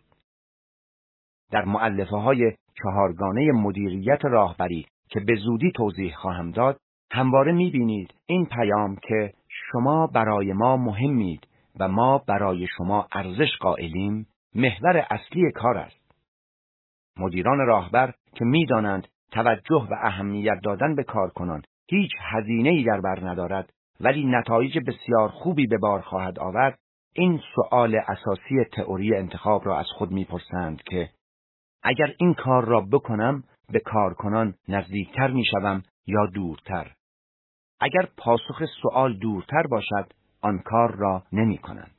در مؤلفه های چهارگانه مدیریت راهبری که به زودی توضیح خواهم داد، همواره می بینید این پیام که شما برای ما مهمید و ما برای شما ارزش قائلیم محور اصلی کار است. مدیران راهبر که می دانند توجه و اهمیت دادن به کارکنان هیچ هزینه‌ای در بر ندارد ولی نتایج بسیار خوبی به بار خواهد آورد، این سؤال اساسی تئوری انتخاب را از خود میپرسند که اگر این کار را بکنم به کارکنان نزدیکتر میشوم یا دورتر؟ اگر پاسخ سؤال دورتر باشد آن کار را نمی کنند.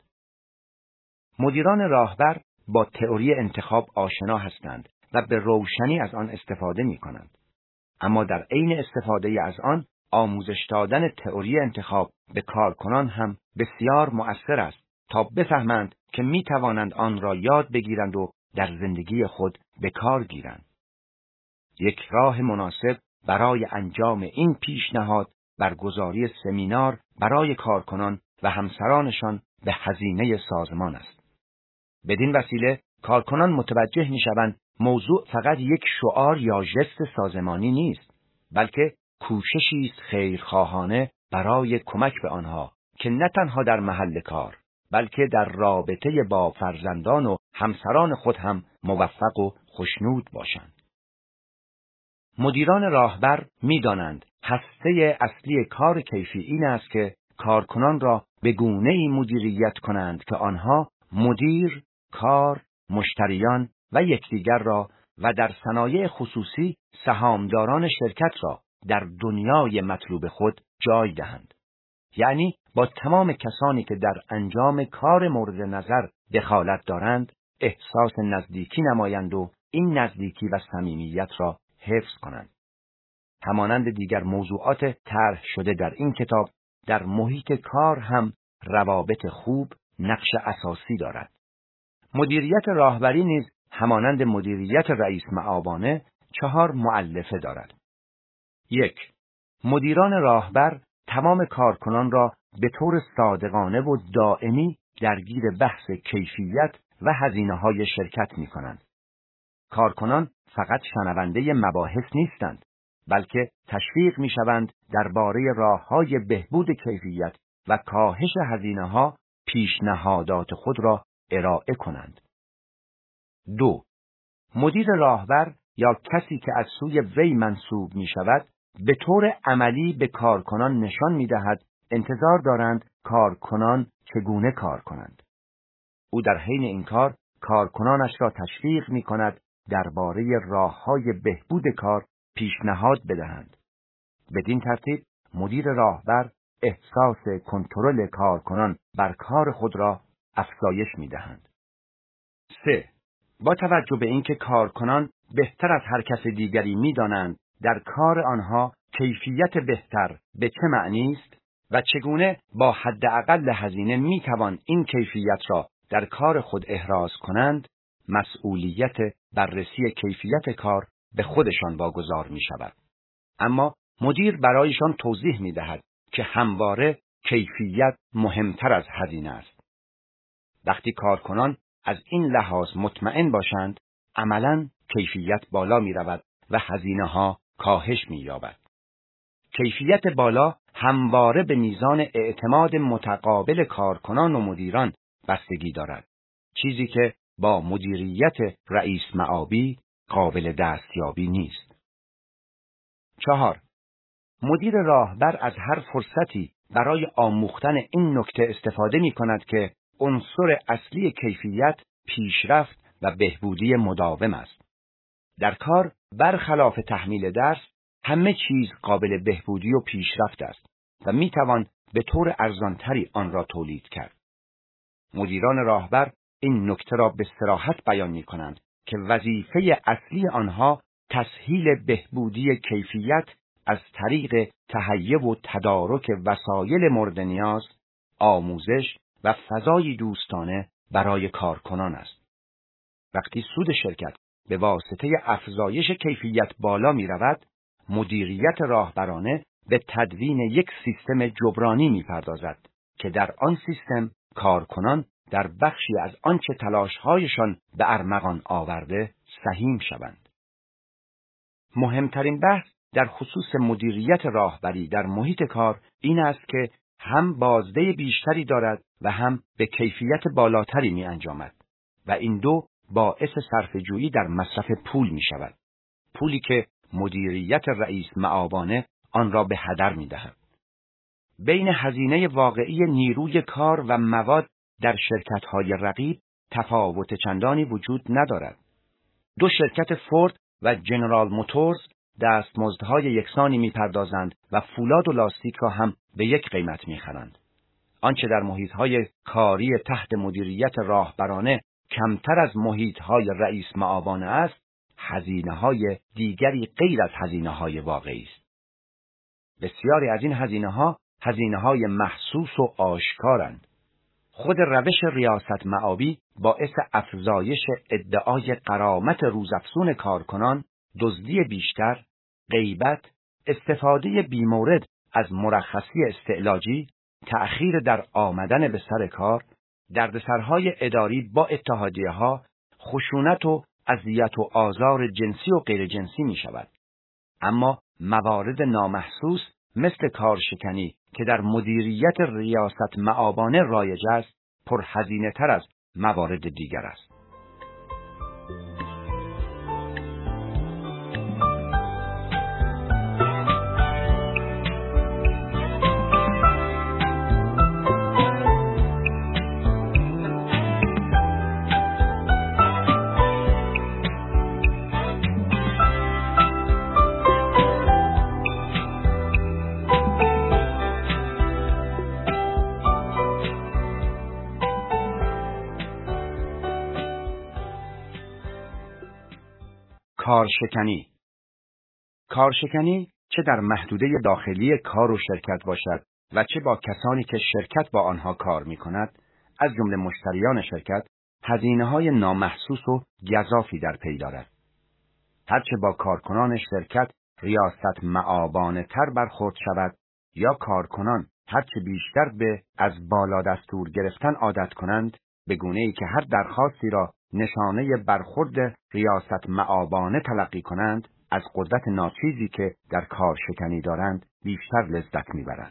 مدیران راهبر با تئوری انتخاب آشنا هستند و به روشنی از آن استفاده می کنند. اما در عین استفاده از آن آموزش دادن تئوری انتخاب به کارکنان هم بسیار مؤثر است تا بفهمند که می توانند آن را یاد بگیرند و در زندگی خود به کار گیرند. یک راه مناسب برای انجام این پیشنهاد برگزاری سمینار برای کارکنان و همسرانشان به هزینه سازمان است. بدین وسیله کارکنان متوجه می‌شوند موضوع فقط یک شعار یا ژست سازمانی نیست، بلکه کوششی است خیرخواهانه برای کمک به آنها که نه تنها در محل کار بلکه در رابطه با فرزندان و همسران خود هم موفق و خوشنود باشند. مدیران راهبر می‌دانند هسته اصلی کار کیفی این است که کارکنان را به گونه‌ای مدیریت کنند که آنها مدیر، کار، مشتریان و یکدیگر را و در صنایع خصوصی سهامداران شرکت را در دنیای مطلوب خود جای دهند. یعنی با تمام کسانی که در انجام کار مورد نظر دخالت دارند احساس نزدیکی نمایند و این نزدیکی و صمیمیت را حفظ کنند. همانند دیگر موضوعات طرح شده در این کتاب، در محیط کار هم روابط خوب نقش اساسی دارد. مدیریت راهبری نیز همانند مدیریت رئیس معاونانه چهار مؤلفه دارد. یک، مدیران راهبر تمام کارکنان را به طور صادقانه و دائمی درگیر بحث کیفیت و هزینه‌های شرکت می‌کنند. کارکنان فقط شنونده مباحث نیستند، بلکه تشویق می‌شوند درباره راه‌های بهبود کیفیت و کاهش هزینه‌ها پیشنهادات خود را ارائه کنند. دو، مدیر راهبر یا کسی که از سوی وی منصوب می‌شود به طور عملی به کارکنان نشان می‌دهد انتظار دارند کارکنان چگونه کار کنند. او در حین این کار کارکنانش را تشویق می‌کند درباره راه‌های بهبود کار پیشنهاد بدهند. بدین ترتیب مدیر راهبر احساس کنترل کارکنان بر کار خود را افزایش می‌دهند. سه، با توجه به اینکه کارکنان بهتر از هر کس دیگری می‌دانند در کار آنها کیفیت بهتر به چه معنی است و چگونه با حداقل هزینه می‌توان این کیفیت را در کار خود احراز کنند، مسئولیت بررسی کیفیت کار به خودشان واگذار می‌شود. اما مدیر برایشان توضیح می‌دهد که همواره کیفیت مهمتر از هزینه است. وقتی کارکنان از این لحاظ مطمئن باشند، عملاً کیفیت بالا می‌رود و هزینه‌ها کاهش می‌یابد. کیفیت بالا همواره به میزان اعتماد متقابل کارکنان و مدیران بستگی دارد، چیزی که با مدیریت رئیس معابی قابل دستیابی نیست. چهار، مدیر راهبر از هر فرصتی برای آموختن این نکته استفاده می‌کند که عنصر اصلی کیفیت پیشرفت و بهبودی مداوم است. در کار برخلاف تحمیل درس همه چیز قابل بهبودی و پیشرفت است و میتوان به طور ارزانتری آن را تولید کرد. مدیران راهبر این نکته را به صراحت بیان می‌کنند که وظیفه اصلی آنها تسهیل بهبودی کیفیت از طریق تهیه و تدارک وسایل مورد نیاز، آموزش و فضای دوستانه برای کارکنان است. وقتی سود شرکت به واسطه افزایش کیفیت بالا می رود، مدیریت راهبرانه به تدوین یک سیستم جبرانی می پردازد که در آن سیستم کارکنان در بخشی از آنچه تلاش‌هایشان به ارمغان آورده سهیم شوند. مهمترین بحث در خصوص مدیریت راهبری در محیط کار این است که هم بازده بیشتری دارد و هم به کیفیت بالاتری می انجامد و این دو باعث صرفه‌جویی در مصرف پول می شود. پولی که مدیریت رئیس معاونانه آن را به هدر می دهد. بین هزینه واقعی نیروی کار و مواد در شرکت‌های رقیب تفاوت چندانی وجود ندارد. دو شرکت فورد و جنرال موتورز دستمزدهای یکسانی می‌پردازند و فولاد و لاستیک را هم به یک قیمت می‌خرند. آنچه در محیط‌های کاری تحت مدیریت راهبرانه کمتر از محیط‌های رئیس معاونانه است، هزینه‌های دیگری غیر از هزینه‌های واقعی است. بسیاری از این هزینه‌ها هزینه‌های محسوس و آشکارند. خود روش ریاست معابی باعث افزایش ادعای غرامت روزافزون کارکنان، دزدی بیشتر، غیبت، استفاده بیمورد از مرخصی استعلاجی، تأخیر در آمدن به سر کار، دردسرهای اداری با اتحادیه‌ها، خشونت و اذیت و آزار جنسی و غیر جنسی می شود. اما موارد نامحسوس مثل کارشکنی که در مدیریت ریاست معابانه رایج است، پرهزینه تر از موارد دیگر است. کارشکنی. کارشکنی چه در محدوده داخلی کار و شرکت باشد و چه با کسانی که شرکت با آنها کار می کند، از جمله مشتریان شرکت، هزینه‌های نامحسوس و گزافی در پی دارد. هرچه با کارکنان شرکت ریاست مآبانه تر برخورد شود یا کارکنان هرچه بیشتر به از بالا دستور گرفتن عادت کنند، به گونه‌ای که هر درخواستی را نشانه برخورد ریاست مآبانه تلقی کنند، از قدرت ناچیزی که در کار شکنی دارند بیشتر لذت میبرند.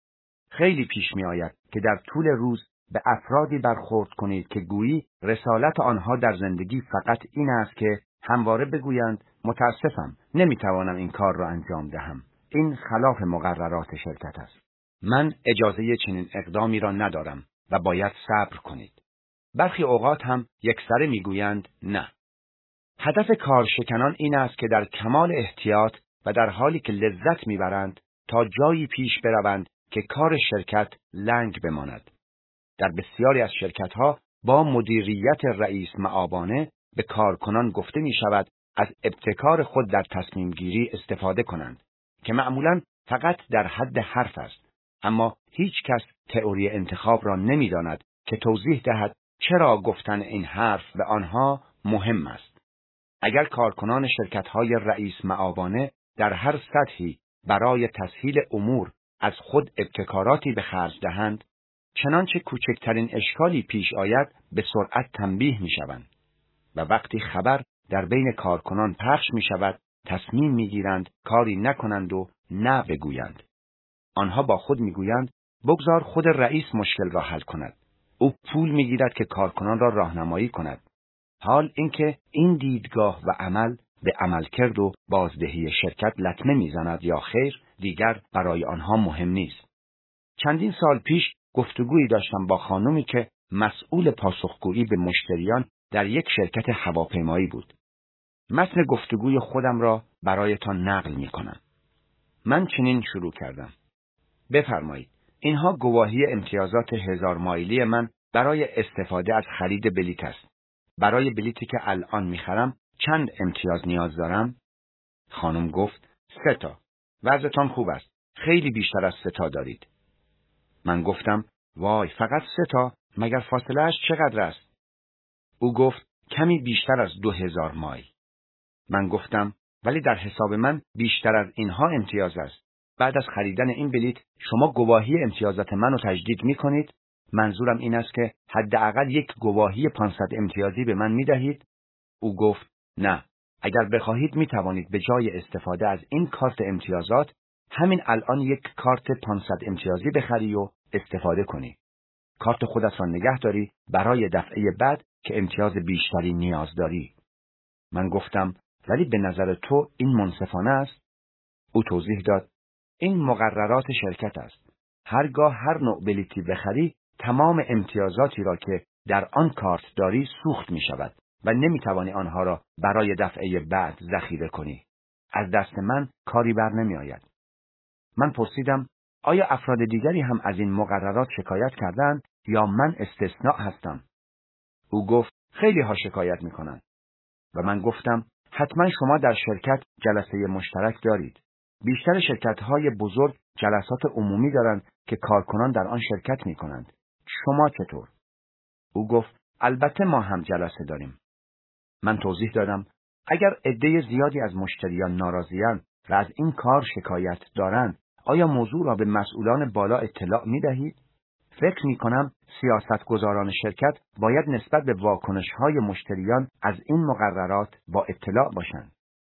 خیلی پیش می آید که در طول روز به افرادی برخورد کنید که گویی رسالت آنها در زندگی فقط این است که همواره بگویند متاسفم، نمیتوانم این کار را انجام دهم. این خلاف مقررات شرکت است. من اجازه چنین اقدامی را ندارم و باید صبر کنید. برخی اوقات هم یکسره میگویند نه. هدف کارشکنان این است که در کمال احتیاط و در حالی که لذت میبرند تا جایی پیش بروند که کار شرکت لنگ بماند. در بسیاری از شرکت‌ها با مدیریت رئیس مآبانه به کارکنان گفته می شود از ابتکار خود در تصمیم گیری استفاده کنند که معمولاً فقط در حد حرف است، اما هیچ کس تئوری انتخاب را نمی داند که توضیح دهد چرا گفتن این حرف به آنها مهم است. اگر کارکنان شرکت‌های رئیس مآبانه در هر سطحی برای تسهیل امور از خود ابتکاراتی به خرج دهند، چنانچه کوچکترین اشکالی پیش آید به سرعت تنبیه می شوند و وقتی خبر در بین کارکنان پخش می شود تصمیم می گیرند کاری نکنند و نه بگویند. آنها با خود می گویند بگذار خود رئیس مشکل را حل کند. او پول می گیرد که کارکنان را راهنمایی کند. حال اینکه این دیدگاه و عمل به عملکرد و بازدهی شرکت لطمه می زند یا خیر دیگر برای آنها مهم نیست. چندین سال پیش گفتگویی داشتم با خانمی که مسئول پاسخگویی به مشتریان در یک شرکت هواپیمایی بود. متن گفتگوی خودم را برایتان نقل می کنم. من چنین شروع کردم. بفرمایید، اینها گواهی امتیازات هزار مایلی من برای استفاده از خرید بلیط است. برای بلیطی که الان می خرم چند امتیاز نیاز دارم؟ خانم گفت سه تا. وضعتان خوب است. خیلی بیشتر از سه تا دارید. من گفتم وای، فقط سه تا؟ مگر فاصله اش چقدر است؟ او گفت کمی بیشتر از دو هزار مایل. من گفتم ولی در حساب من بیشتر از اینها امتیاز است. بعد از خریدن این بلیط شما گواهی امتیازات منو تجدید می کنید؟ منظورم این است که حداقل یک گواهی پانصد امتیازی به من می دهید؟ او گفت نه، اگر بخواهید می توانید به جای استفاده از این کارت امتیازات همین الان یک کارت پانصد امتیازی بخری و استفاده کنی. کارت خودت را نگه داری برای دفعه بعد که امتیاز بیشتری نیاز داری. من گفتم ولی به نظر تو این منصفانه است؟ او توضیح داد این مقررات شرکت است. هرگاه هر نوع بلیطی بخری تمام امتیازاتی را که در آن کارت داری سوخت می شود و نمی توانی آنها را برای دفعه بعد ذخیره کنی. از دست من کاری بر نمی آید. من پرسیدم آیا افراد دیگری هم از این مقررات شکایت کردند یا من استثناء هستم؟ او گفت خیلی ها شکایت می کنند. و من گفتم حتما شما در شرکت جلسه مشترک دارید. بیشتر شرکت‌های بزرگ جلسات عمومی دارند که کارکنان در آن شرکت می کنند. شما چطور؟ او گفت البته ما هم جلسه داریم. من توضیح دادم اگر عده زیادی از مشتریان ناراضی‌اند و از این کار شکایت دارند، آیا موضوع را به مسئولان بالا اطلاع می دهید؟ فکر می کنم سیاستگزاران شرکت باید نسبت به واکنش‌های مشتریان از این مقررات با اطلاع باشند.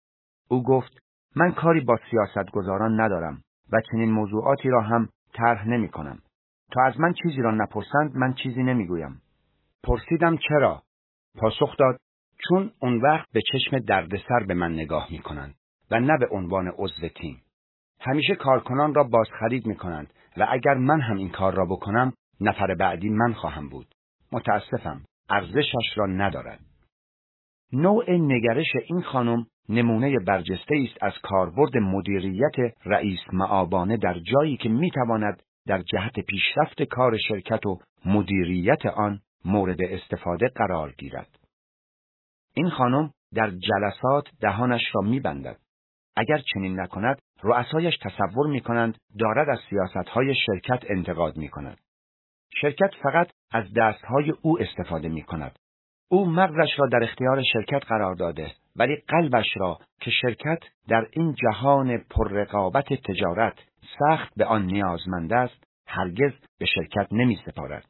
او گفت من کاری با سیاستگزاران ندارم و چنین موضوعاتی را هم طرح نمی کنم. تا از من چیزی را نپرسند من چیزی نمیگویم. پرسیدم چرا؟ پاسخ داد چون اون وقت به چشم دردسر به من نگاه میکنند و نه به عنوان عضو تیم. همیشه کارکنان را بازخرید میکنند و اگر من هم این کار را بکنم نفر بعدی من خواهم بود. متاسفم، ارزشش را ندارد. نوع نگرش این خانم نمونه برجسته است از کاربرد مدیریت رئیس مآبانه در جایی که میتواند در جهت پیشرفت کار شرکت و مدیریت آن مورد استفاده قرار گیرد. این خانم در جلسات دهانش را میبندد. اگر چنین نکند، رؤسایش تصور میکنند دارد از سیاستهای شرکت انتقاد میکند. شرکت فقط از دستهای او استفاده میکند. او مغزش را در اختیار شرکت قرار داده، ولی قلبش را که شرکت در این جهان پررقابت تجارت سخت به آن نیازمند است، هرگز به شرکت نمی سپارد.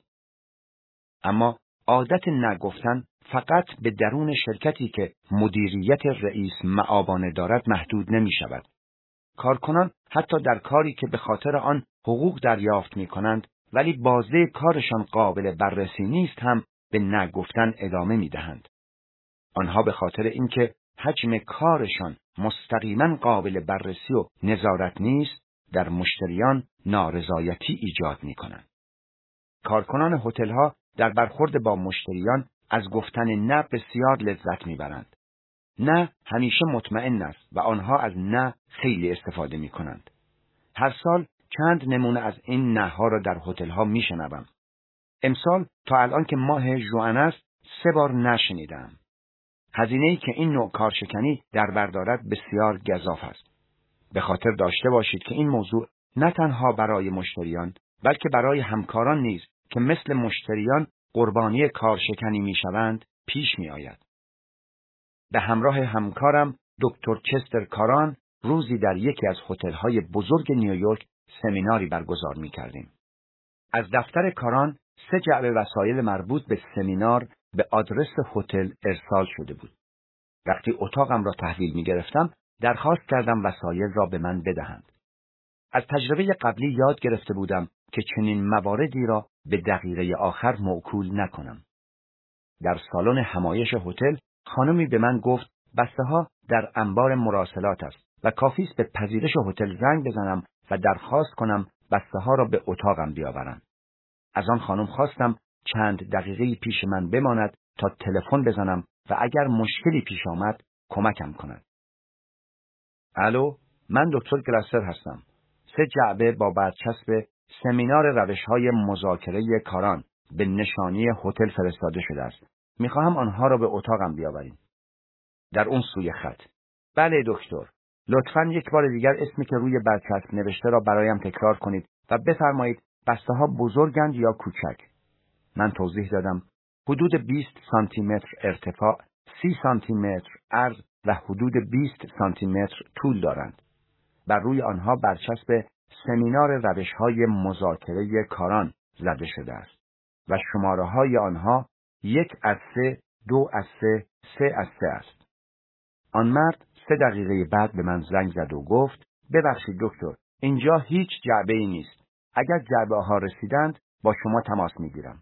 اما عادت نگفتن فقط به درون شرکتی که مدیریت رئیس مآبانه دارد محدود نمی شود. کارکنان حتی در کاری که به خاطر آن حقوق دریافت می کنند ولی بازده کارشان قابل بررسی نیست هم به نگفتن ادامه می دهند. آنها به خاطر اینکه حجم کارشان مستقیما قابل بررسی و نظارت نیست، در مشتریان نارضایتی ایجاد می کنند. کارکنان هتل‌ها در برخورد با مشتریان از گفتن نه بسیار لذت می برند. نه همیشه مطمئن است و آنها از نه خیلی استفاده می کنند. هر سال چند نمونه از این نه ها را در هتل‌ها می شنوم. امسال تا الان که ماه ژوئن است سه بار نشنیدم. هزینه‌ای که این نوع کارشکنی در بر دارد بسیار گزاف است. به خاطر داشته باشید که این موضوع نه تنها برای مشتریان بلکه برای همکاران نیز که مثل مشتریان قربانی کارشکنی میشوند پیش می آید. به همراه همکارم دکتر چستر کاران روزی در یکی از هتل‌های بزرگ نیویورک سمیناری برگزار می کردیم. از دفتر کاران سه جعبه وسایل مربوط به سمینار به آدرس هتل ارسال شده بود. وقتی اتاقم را تحویل می گرفتم درخواست کردم وسایل را به من بدهند. از تجربه قبلی یاد گرفته بودم که چنین مواردی را به دقیقه آخر موکول نکنم. در سالن همایش هتل خانمی به من گفت بسته ها در انبار مراسلات است و کافی است به پذیرش هتل زنگ بزنم و درخواست کنم بسته ها را به اتاقم بیاورند. از آن خانم خواستم چند دقیقه پیش من بماند تا تلفن بزنم و اگر مشکلی پیش آمد کمکم کند. الو، من دکتر گلاسر هستم. سه جعبه با برچسب سمینار روش‌های مذاکره کاران به نشانی هتل فرستاده شده است. می‌خواهم آنها را به اتاقم بیاورید. در اون سوی خط. بله دکتر. لطفاً یک بار دیگر اسمی که روی برچسب نوشته را برایم تکرار کنید و بفرمایید بسته‌ها بزرگند یا کوچک. من توضیح دادم حدود بیست سانتی متر ارتفاع، سی سانتی متر عرض و حدود بیست سانتی متر طول دارند. بر روی آنها برچسب سمینار روش‌های مذاکره کاران زده شده است و شماره‌های آنها یک از سه، دو از سه، سه از سه است. آن مرد سه دقیقه بعد به من زنگ زد و گفت ببخشید دکتر، اینجا هیچ جعبه‌ای نیست. اگر جعبه ها رسیدند با شما تماس میگیرم.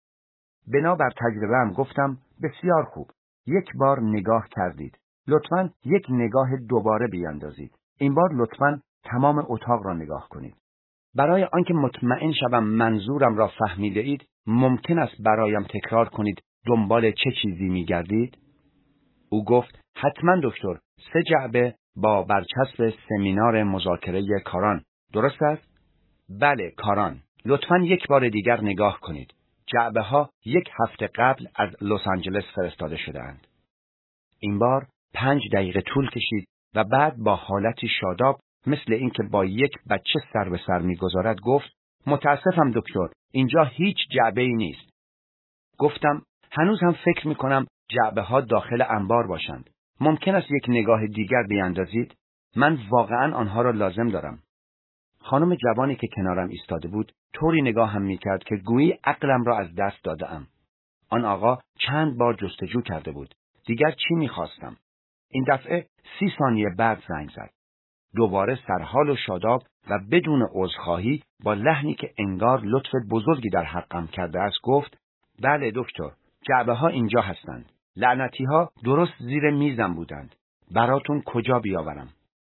بنابر تجربه‌ام گفتم بسیار خوب. یک بار نگاه کردید. لطفاً یک نگاه دوباره بیاندازید. این بار لطفاً تمام اتاق را نگاه کنید. برای آنکه مطمئن شوم منظورم را فهمیده اید، ممکن است برایم تکرار کنید دنبال چه چیزی می‌گردید؟ او گفت حتما دکتر، سه جعبه با برچسب سمینار مذاکره کاران. درست است؟ بله، کاران. لطفاً یک بار دیگر نگاه کنید. جعبه ها یک هفته قبل از لس آنجلس فرستاده شده اند. این بار پنج دقیقه طول کشید و بعد با حالتی شاداب مثل اینکه با یک بچه سر به سر می‌گذارد گفت متاسفم دکتر، اینجا هیچ جعبه‌ای نیست. گفتم هنوز هم فکر می‌کنم جعبه ها داخل انبار باشند. ممکن است یک نگاه دیگر بیاندازید؟ من واقعاً آنها را لازم دارم. خانم جوانی که کنارم ایستاده بود طوری نگاه هم می‌کرد که گویی عقلم را از دست داده‌ام. آن آقا چند بار جستجو کرده بود. دیگر چی می‌خواستم؟ این دفعه سی ثانیه بعد زنگ زد. دوباره سرحال و شاداب و بدون عذرخواهی با لحنی که انگار لطف بزرگی در حقم کرده است گفت: بله دکتر، جعبه ها اینجا هستند. لعنتی ها درست زیر میزم بودند. براتون کجا بیاورم؟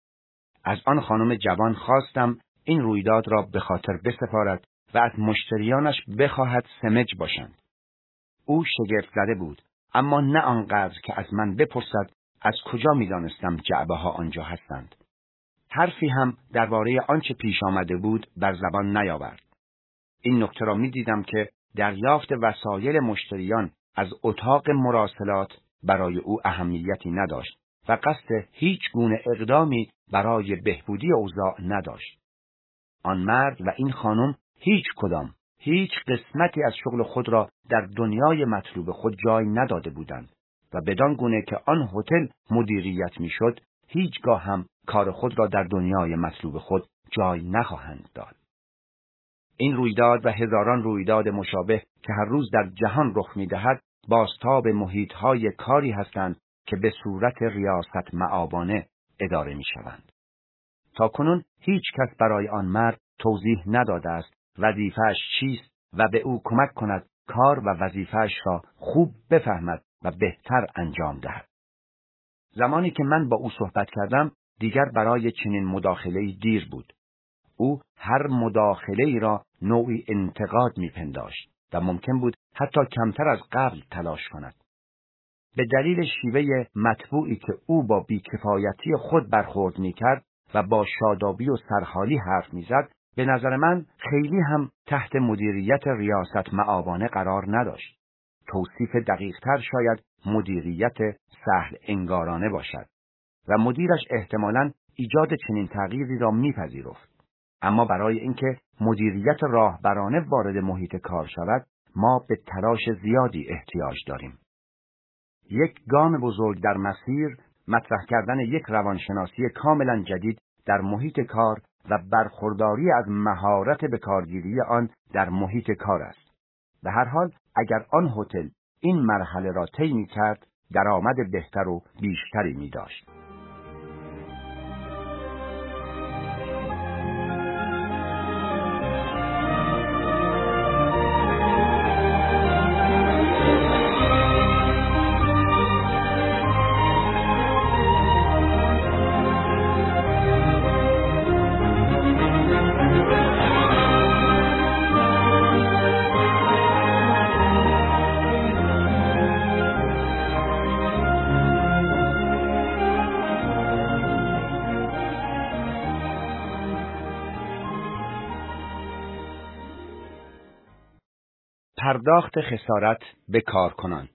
از آن خانم جوان خواستم این رویداد را به خاطر بسپارد و از مشتریانش بخواهد سمج باشند. او شگفت زده بود، اما نه آنقدر که از من بپرسد از کجا می‌دانستم جعبه ها آنجا هستند. حرفی هم درباره آنچه پیش آمده بود بر زبان نیاورد. این نکته را می‌دیدم که دریافت وسایل مشتریان از اتاق مراسلات برای او اهمیتی نداشت و قصد هیچ گونه اقدامی برای بهبودی اوضاع نداشت. آن مرد و این خانم هیچ کدام، هیچ قسمتی از شغل خود را در دنیای مطلوب خود جای نداده بودند و بدان گونه که آن هتل مدیریت میشد، هیچگاه هم کار خود را در دنیای مطلوب خود جای نخواهند داد. این رویداد و هزاران رویداد مشابه که هر روز در جهان رخ می‌دهد، بازتاب محیط‌های کاری هستند که به صورت ریاست مآبانه اداره می‌شوند. تاکنون هیچ کس برای آن مرد توضیح نداده است وظیفه‌اش چیست و به او کمک کند کار و وظیفه‌اش را خوب بفهمد و بهتر انجام دهد. زمانی که من با او صحبت کردم، دیگر برای چنین مداخله‌ای دیر بود. او هر مداخله‌ای را نوعی انتقاد می‌پنداشت و ممکن بود حتی کمتر از قبل تلاش کند. به دلیل شیوه مطبوعی که او با بیکفایتی خود برخورد می‌کرد و با شادابی و سرحالی حرف می‌زد، به نظر من خیلی هم تحت مدیریت ریاست مآبانه قرار نداشت. توصیف دقیق‌تر شاید مدیریت سهل انگارانه باشد و مدیرش احتمالاً ایجاد چنین تغییری را می‌پذیرفت. اما برای اینکه مدیریت راهبرانه وارد محیط کار شود، ما به تلاش زیادی احتیاج داریم. یک گام بزرگ در مسیر مطرح کردن یک روانشناسی کاملا جدید در محیط کار و برخورداری از مهارت به کارگیری آن در محیط کار است. به هر حال اگر آن هتل این مرحله را طی می‌کرد، درآمد بهتر و بیشتری می‌داشت. پرداخت خسارت به کارکنان.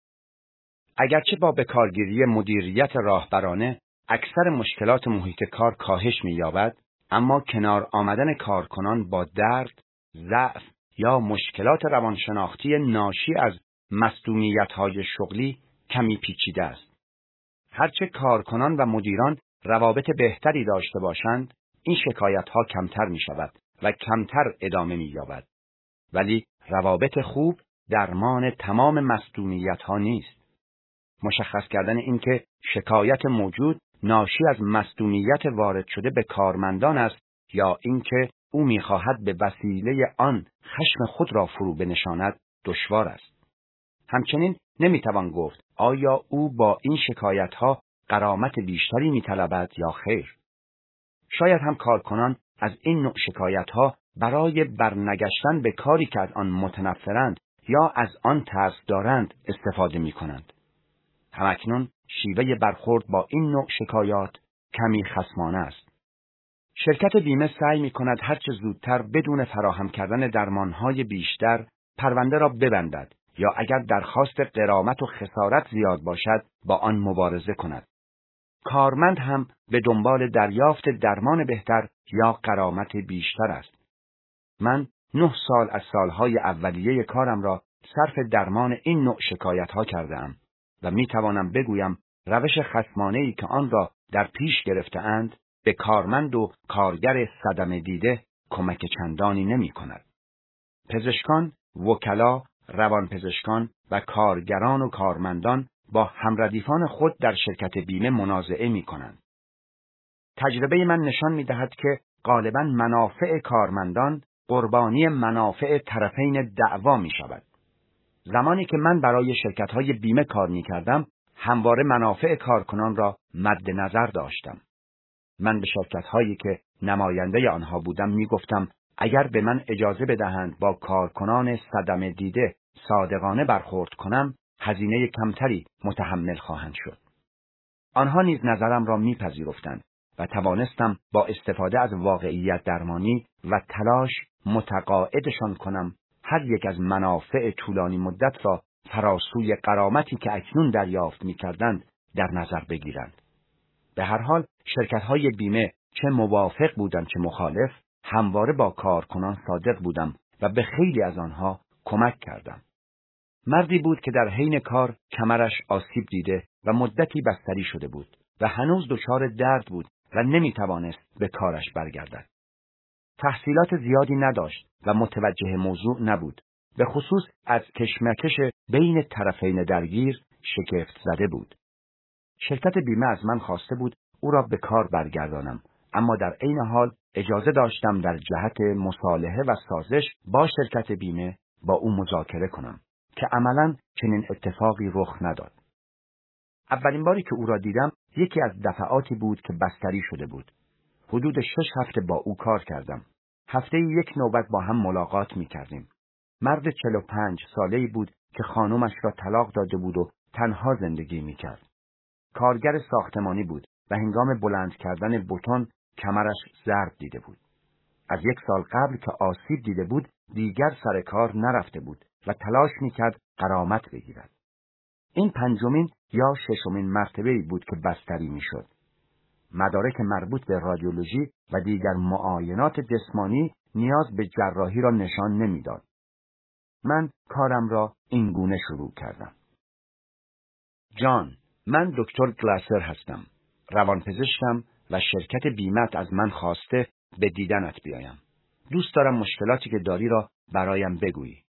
اگرچه با بکارگیری مدیریت راهبرانه اکثر مشکلات محیط کار کاهش می‌یابد، اما کنار آمدن کارکنان با درد، ضعف یا مشکلات روانشناختی ناشی از مصدومیت‌های شغلی کمی پیچیده است. هرچه کارکنان و مدیران روابط بهتری داشته باشند، این شکایت‌ها کمتر می‌شود و کمتر ادامه می‌یابد. ولی روابط خوب درمان تمام مصدومیت‌ها نیست. مشخص کردن اینکه شکایت موجود ناشی از مصدومیت وارد شده به کارمندان است یا اینکه او می‌خواهد به وسیله آن خشم خود را فرو بنشاند دشوار است. همچنین نمی‌توان گفت آیا او با این شکایت‌ها غرامت بیشتری می‌طلبد یا خیر. شاید هم کارکنان از این نوع شکایت‌ها برای برنگشتن به کاری که از آن متنفرند یا از آن ترس دارند استفاده می‌کنند. همکنون شیوه برخورد با این نوع شکایات کمی خصمانه است. شرکت بیمه سعی می‌کند هر چه زودتر بدون فراهم کردن درمان‌های بیشتر پرونده را ببندد یا اگر درخواست غرامت و خسارت زیاد باشد با آن مبارزه کند. کارمند هم به دنبال دریافت درمان بهتر یا غرامت بیشتر است. من نه سال از سالهای اولیه کارم را صرف درمان این نوع شکایت‌ها کرده‌ام و می‌توانم بگویم روش خصمانه‌ای که آن را در پیش گرفته‌اند به کارمند و کارگر صدمه دیده کمک چندانی نمی‌کند. پزشکان، وکلا، روانپزشکان و کارگران و کارمندان با همردیفان خود در شرکت بیمه منازعه می‌کنند. تجربه من نشان می‌دهد که غالباً منافع کارمندان قربانی منافع طرفین دعوا می‌شود. زمانی که من برای شرکت‌های بیمه کار می‌کردم، همواره منافع کارکنان را مد نظر داشتم. من به شرکت‌هایی که نماینده آنها بودم می‌گفتم اگر به من اجازه بدهند با کارکنان صدمه دیده صادقانه برخورد کنم، هزینه کمتری متحمل خواهند شد. آنها نیز نظرم را می‌پذیرفتند و توانستم با استفاده از واقعیت درمانی و تلاش متقاعدشان کنم هر یک از منافع طولانی مدت را فراسوی غرامتی که اکنون دریافت می‌کردند در نظر بگیرند. به هر حال شرکت‌های بیمه چه موافق بودند چه مخالف، همواره با کارکنان صادق بودم و به خیلی از آنها کمک کردم. مردی بود که در حین کار کمرش آسیب دیده و مدتی بستری شده بود و هنوز دچار درد بود و نمی‌توانست به کارش برگردد. تحصیلات زیادی نداشت و متوجه موضوع نبود. به خصوص از کشمکش بین طرفین درگیر شگفت زده بود. شرکت بیمه از من خواسته بود او را به کار برگردانم، اما در عین حال اجازه داشتم در جهت مصالحه و سازش با شرکت بیمه با او مذاکره کنم که عملاً چنین اتفاقی رخ نداد. اولین باری که او را دیدم یکی از دفعاتی بود که بستری شده بود. حدود شش هفته با او کار کردم. هفته یک نوبت با هم ملاقات می کردیم. مرد چهل و پنج ساله‌ای بود که خانومش را طلاق داده بود و تنها زندگی می کرد. کارگر ساختمانی بود و هنگام بلند کردن بتون کمرش ضرب دیده بود. از یک سال قبل که آسیب دیده بود دیگر سر کار نرفته بود و تلاش میکرد غرامت بگیرد. این پنجمین یا ششمین مرتبه‌ای بود که بستری میشد. مدارک مربوط به رادیولوژی و دیگر معاینات جسمانی نیاز به جراحی را نشان نمیداد. من کارم را این گونه شروع کردم. جان، من دکتر گلاسر هستم. روانپزشکم و شرکت بیمت از من خواسته به دیدنت بیایم. دوست دارم مشکلاتی که داری را برایم بگویی.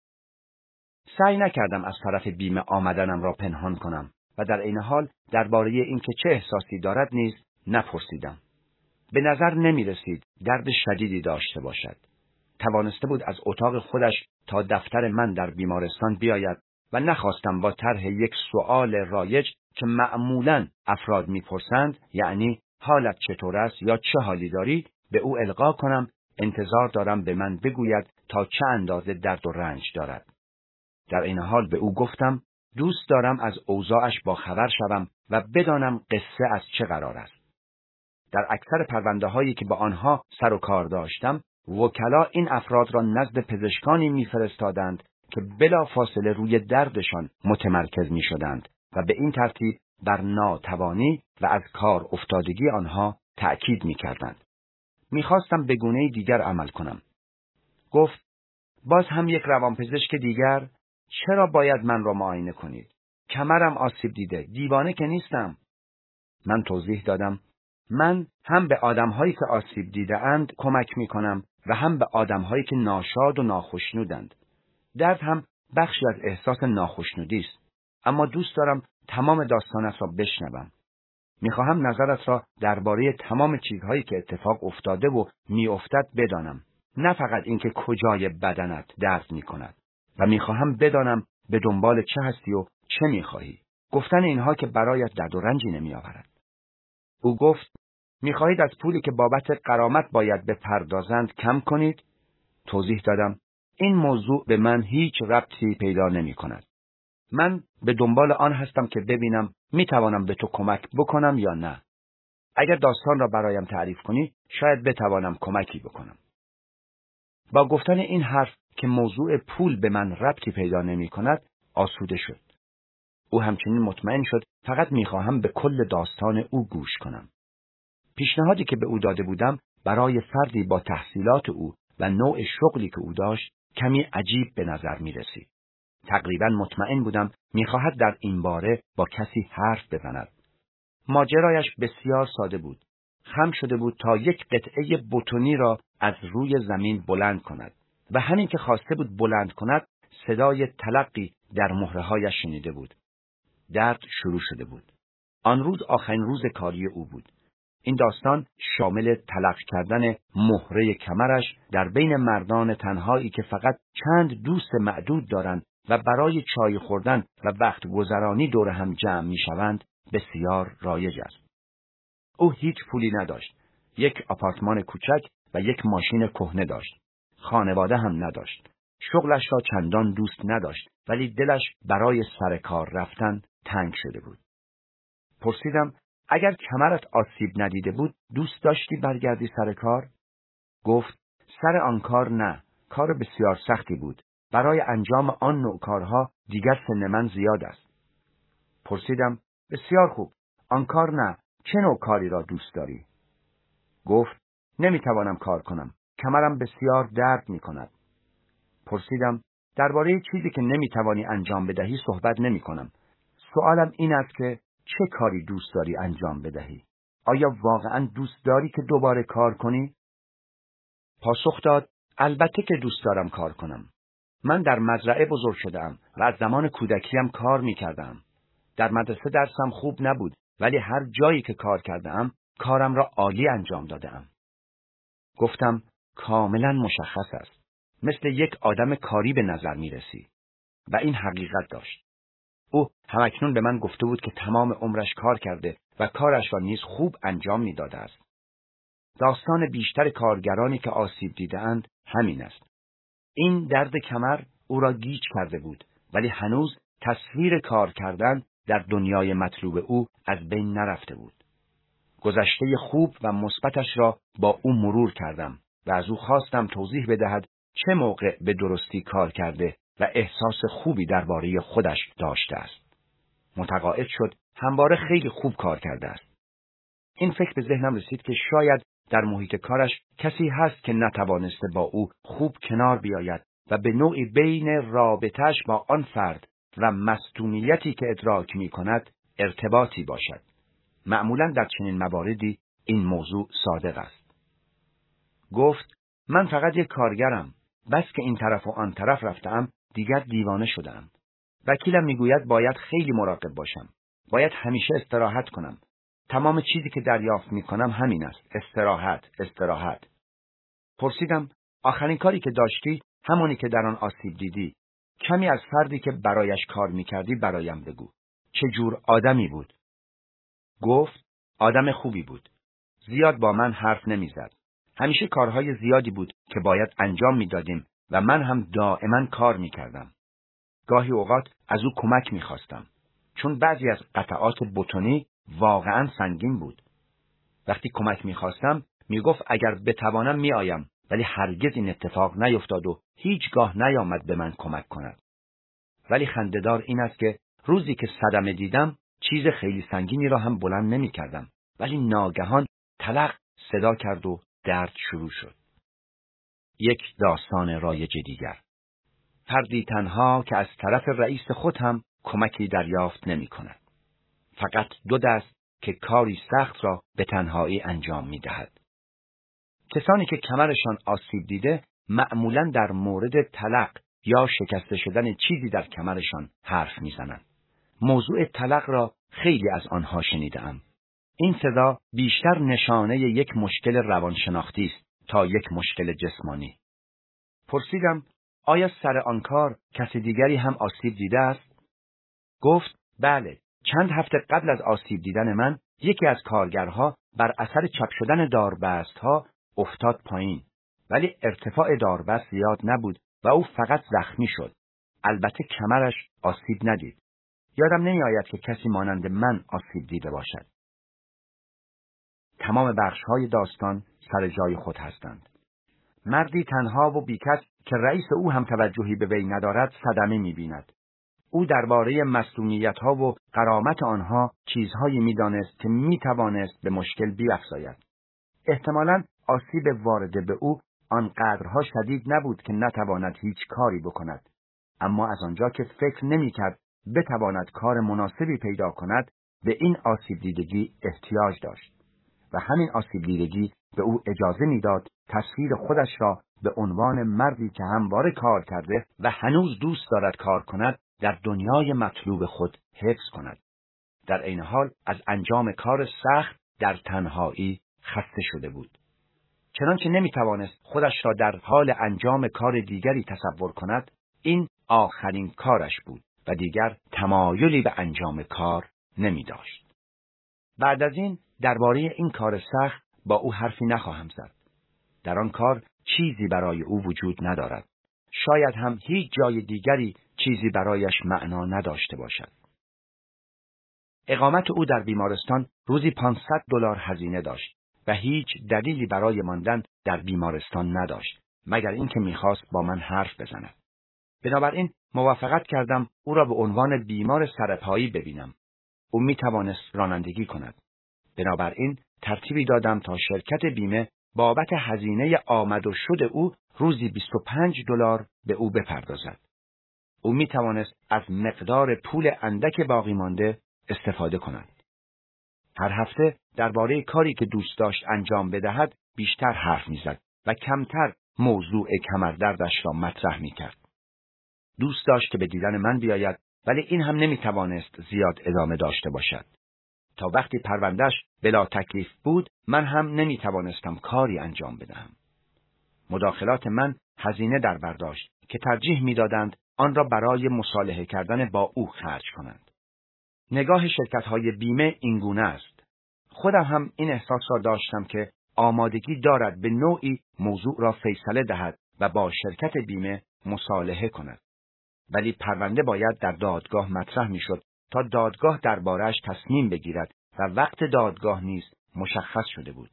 سعی نکردم از طرف بیمه آمدنم را پنهان کنم و در عین حال درباره اینکه چه احساسی دارد نیز نپرسیدم. به نظر نمی رسید درد شدیدی داشته باشد. توانسته بود از اتاق خودش تا دفتر من در بیمارستان بیاید و نخواستم با طرح یک سؤال رایج که معمولاً افراد میپرسند، یعنی حالت چطور است یا چه حالی داری، به او القا کنم انتظار دارم به من بگوید تا چه اندازه درد و رنج دارد. در این حال به او گفتم دوست دارم از اوضاعش با خبر شوم و بدانم قصه از چه قرار است. در اکثر پرونده هایی که با آنها سر و کار داشتم، وکلا این افراد را نزد پزشکانی میفرستادند که بلا فاصله روی دردشان متمرکز می شدند و به این ترتیب بر ناتوانی و از کار افتادگی آنها تأکید می کردند. می خواستم به گونه دیگر عمل کنم. گفت باز هم یک روانپزشک دیگر؟ چرا باید من را معاینه کنید؟ کمرم آسیب دیده، دیوانه که نیستم. من توضیح دادم من هم به آدم‌هایی که آسیب دیده اند کمک می کنم و هم به آدم‌هایی که ناشاد و ناخشنودند. درد هم بخشی از احساس ناخشنودی است، اما دوست دارم تمام داستانت را بشنوم. میخواهم نظرت را درباره تمام چیزهایی که اتفاق افتاده و میافتد بدانم، نه فقط اینکه کجای بدنت درد میکند. و میخواهم بدانم به دنبال چه هستی و چه میخواهی. گفتن اینها که برایت درد و رنجی نمیآورد. او گفت میخواهید از پولی که بابت غرامت باید بپردازند کم کنید؟ توضیح دادم این موضوع به من هیچ ربطی پیدا نمی کند. من به دنبال آن هستم که ببینم می توانم به تو کمک بکنم یا نه. اگر داستان را برایم تعریف کنی شاید بتوانم کمکی بکنم. با گفتن این حرف که موضوع پول به من ربطی پیدا نمی کند آسوده شد. او همچنین مطمئن شد فقط می خواهم به کل داستان او گوش کنم. پیشنهادی که به او داده بودم برای فردی با تحصیلات او و نوع شغلی که او داشت کمی عجیب به نظر می رسید. تقریبا مطمئن بودم می خواهد در این باره با کسی حرف بزند. ماجرایش بسیار ساده بود. خم شده بود تا یک قطعه بتونی را از روی زمین بلند کند و همین که خواسته بود بلند کند صدای تلقی در مهره‌هایش شنیده بود. درد شروع شده بود. آن روز آخرین روز کاری او بود. این داستان شامل تلق کردن مهره کمرش در بین مردان تنهایی که فقط چند دوست معدود دارند و برای چای خوردن و وقت گذرانی دور هم جمع می شوند بسیار رایج است. او هیچ پولی نداشت. یک آپارتمان کوچک و یک ماشین کهنه داشت. خانواده هم نداشت. شغلش را چندان دوست نداشت، ولی دلش برای سر کار رفتن تنگ شده بود. پرسیدم اگر کمرت آسیب ندیده بود دوست داشتی برگردی سر کار؟ گفت سر آن کار نه، کار بسیار سختی بود. برای انجام آن نوع کارها دیگر سن من زیاد است. پرسیدم بسیار خوب، آن کار نه، چه نوع کاری را دوست داری؟ گفت نمیتوانم کار کنم، کمرم بسیار درد میکند. پرسیدم درباره چیزی که نمیتوانی انجام بدهی صحبت نمی کنم. سوالم این است که چه کاری دوست داری انجام بدهی؟ آیا واقعا دوست داری که دوباره کار کنی؟ پاسخ داد البته که دوست دارم کار کنم. من در مزرعه بزرگ شدم و از زمان کودکیم کار میکردم. در مدرسه درسم خوب نبود، ولی هر جایی که کار کردم کارم را عالی انجام دادم. گفتم کاملا مشخص است. مثل یک آدم کاری به نظر می رسی. و این حقیقت داشت. او همکنون به من گفته بود که تمام عمرش کار کرده و کارش را نیز خوب انجام می داده است. داستان بیشتر کارگرانی که آسیب دیده‌اند همین است. این درد کمر او را گیج کرده بود، ولی هنوز تصویر کار کردن در دنیای مطلوب او از بین نرفته بود. گذشته خوب و مثبتش را با او مرور کردم و از او خواستم توضیح بدهد چه موقع به درستی کار کرده و احساس خوبی درباره خودش داشته است. متقاعد شد همواره خیلی خوب کار کرده است. این فکر به ذهنم رسید که شاید در محیط کارش کسی هست که نتوانسته با او خوب کنار بیاید و به نوعی بین رابطه‌اش با آن فرد و مصدومیتی که ادراک می کند ارتباطی باشد. معمولاً در چنین مواردی این موضوع صادق است. گفت من فقط یک کارگرم. بس که این طرف و آن طرف رفتم دیگر دیوانه شدم. وکیلم میگوید باید خیلی مراقب باشم. باید همیشه استراحت کنم. تمام چیزی که دریافت میکنم همین است. استراحت، استراحت. پرسیدم آخرین کاری که داشتی همونی که در آن آسیب دیدی. کمی از فردی که برایش کار میکردی برایم بگو. چه جور آدمی بود؟ گفت آدم خوبی بود. زیاد با من حرف نمیزد. همیشه کارهای زیادی بود که باید انجام میدادیم و من هم دائما کار میکردم. گاهی اوقات از او کمک میخواستم، چون بعضی از قطعات بتونی واقعا سنگین بود. وقتی کمک میخواستم میگفت اگر بتوانم میآیم، ولی هرگز این اتفاق نیفتاد و هیچگاه نیامد به من کمک کند. ولی خنده‌دار این است که روزی که صدمه دیدم چیز خیلی سنگینی را هم بلند نمیکردم، ولی ناگهان تلق صدا کرد و درد شروع شد. یک داستان رایج دیگر. فردی تنها که از طرف رئیس خود هم کمکی دریافت نمی کند. فقط دو دست که کاری سخت را به تنهایی انجام می دهد. کسانی که کمرشان آسیب دیده معمولاً در مورد تلق یا شکسته شدن چیزی در کمرشان حرف می زنند. موضوع تلق را خیلی از آنها شنیدم. این صدا بیشتر نشانه یک مشکل روانشناختی است تا یک مشکل جسمانی. پرسیدم آیا سر آن کار کسی دیگری هم آسیب دیده است؟ گفت بله، چند هفته قبل از آسیب دیدن من یکی از کارگرها بر اثر چپ شدن داربستها افتاد پایین، ولی ارتفاع داربست زیاد نبود و او فقط زخمی شد. البته کمرش آسیب ندید. یادم نمی آید که کسی مانند من آسیب دیده باشد. تمام بخش‌های داستان سر جای خود هستند. مردی تنها و بیکس که رئیس او هم توجهی به وی ندارد صدمه می‌بیند. او درباره مسئولیت‌ها و غرامت آنها چیزهایی می‌دانست که می‌توانست به مشکل بیفزاید. احتمالاً آسیب وارده به او آنقدرها شدید نبود که نتواند هیچ کاری بکند، اما از آنجا که فکر نمی‌کرد بتواند کار مناسبی پیدا کند به این آسیب دیدگی احتیاج داشت و همین آسیب دیدگی به او اجازه میداد تصویر خودش را به عنوان مردی که همواره کار کرده و هنوز دوست دارد کار کند در دنیای مطلوب خود حفظ کند. در این حال از انجام کار سخت در تنهایی خسته شده بود. چنانچه نمیتوانست خودش را در حال انجام کار دیگری تصور کند، این آخرین کارش بود و دیگر تمایلی به انجام کار نمی داشت. بعد از این درباره این کار سخت با او حرفی نخواهم زد. در آن کار چیزی برای او وجود ندارد. شاید هم هیچ جای دیگری چیزی برایش معنا نداشته باشد. اقامت او در بیمارستان روزی پانصد دلار هزینه داشت و هیچ دلیلی برای ماندن در بیمارستان نداشت مگر اینکه می‌خواست با من حرف بزند. بنابراین موافقت کردم او را به عنوان بیمار سرپایی ببینم. او می‌توانست رانندگی کند. بنابراین ترتیبی دادم تا شرکت بیمه بابت هزینه آمد و شد او روزی بیست و پنج دلار به او بپردازد. او می‌توانست از مقدار پول اندک باقی مانده استفاده کند. هر هفته درباره کاری که دوست داشت انجام بدهد بیشتر حرف می‌زد و کمتر موضوع کمردردش را مطرح می‌کرد. دوست داشت که به دیدن من بیاید، ولی این هم نمی‌توانست زیاد ادامه داشته باشد. تا وقتی پروندهش بلا تکلیف بود، من هم نمی‌توانستم کاری انجام بدهم. مداخلات من هزینه در برداشت که ترجیح می‌دادند آن را برای مصالحه کردن با او خرج کنند. نگاه شرکت‌های بیمه اینگونه است. خودم هم این احساس را داشتم که آمادگی دارد به نوعی موضوع را فیصله دهد و با شرکت بیمه مصالحه کند. ولی پرونده باید در دادگاه مطرح می‌شد تا دادگاه درباره‌اش تصمیم بگیرد و وقت دادگاه نیز مشخص شده بود.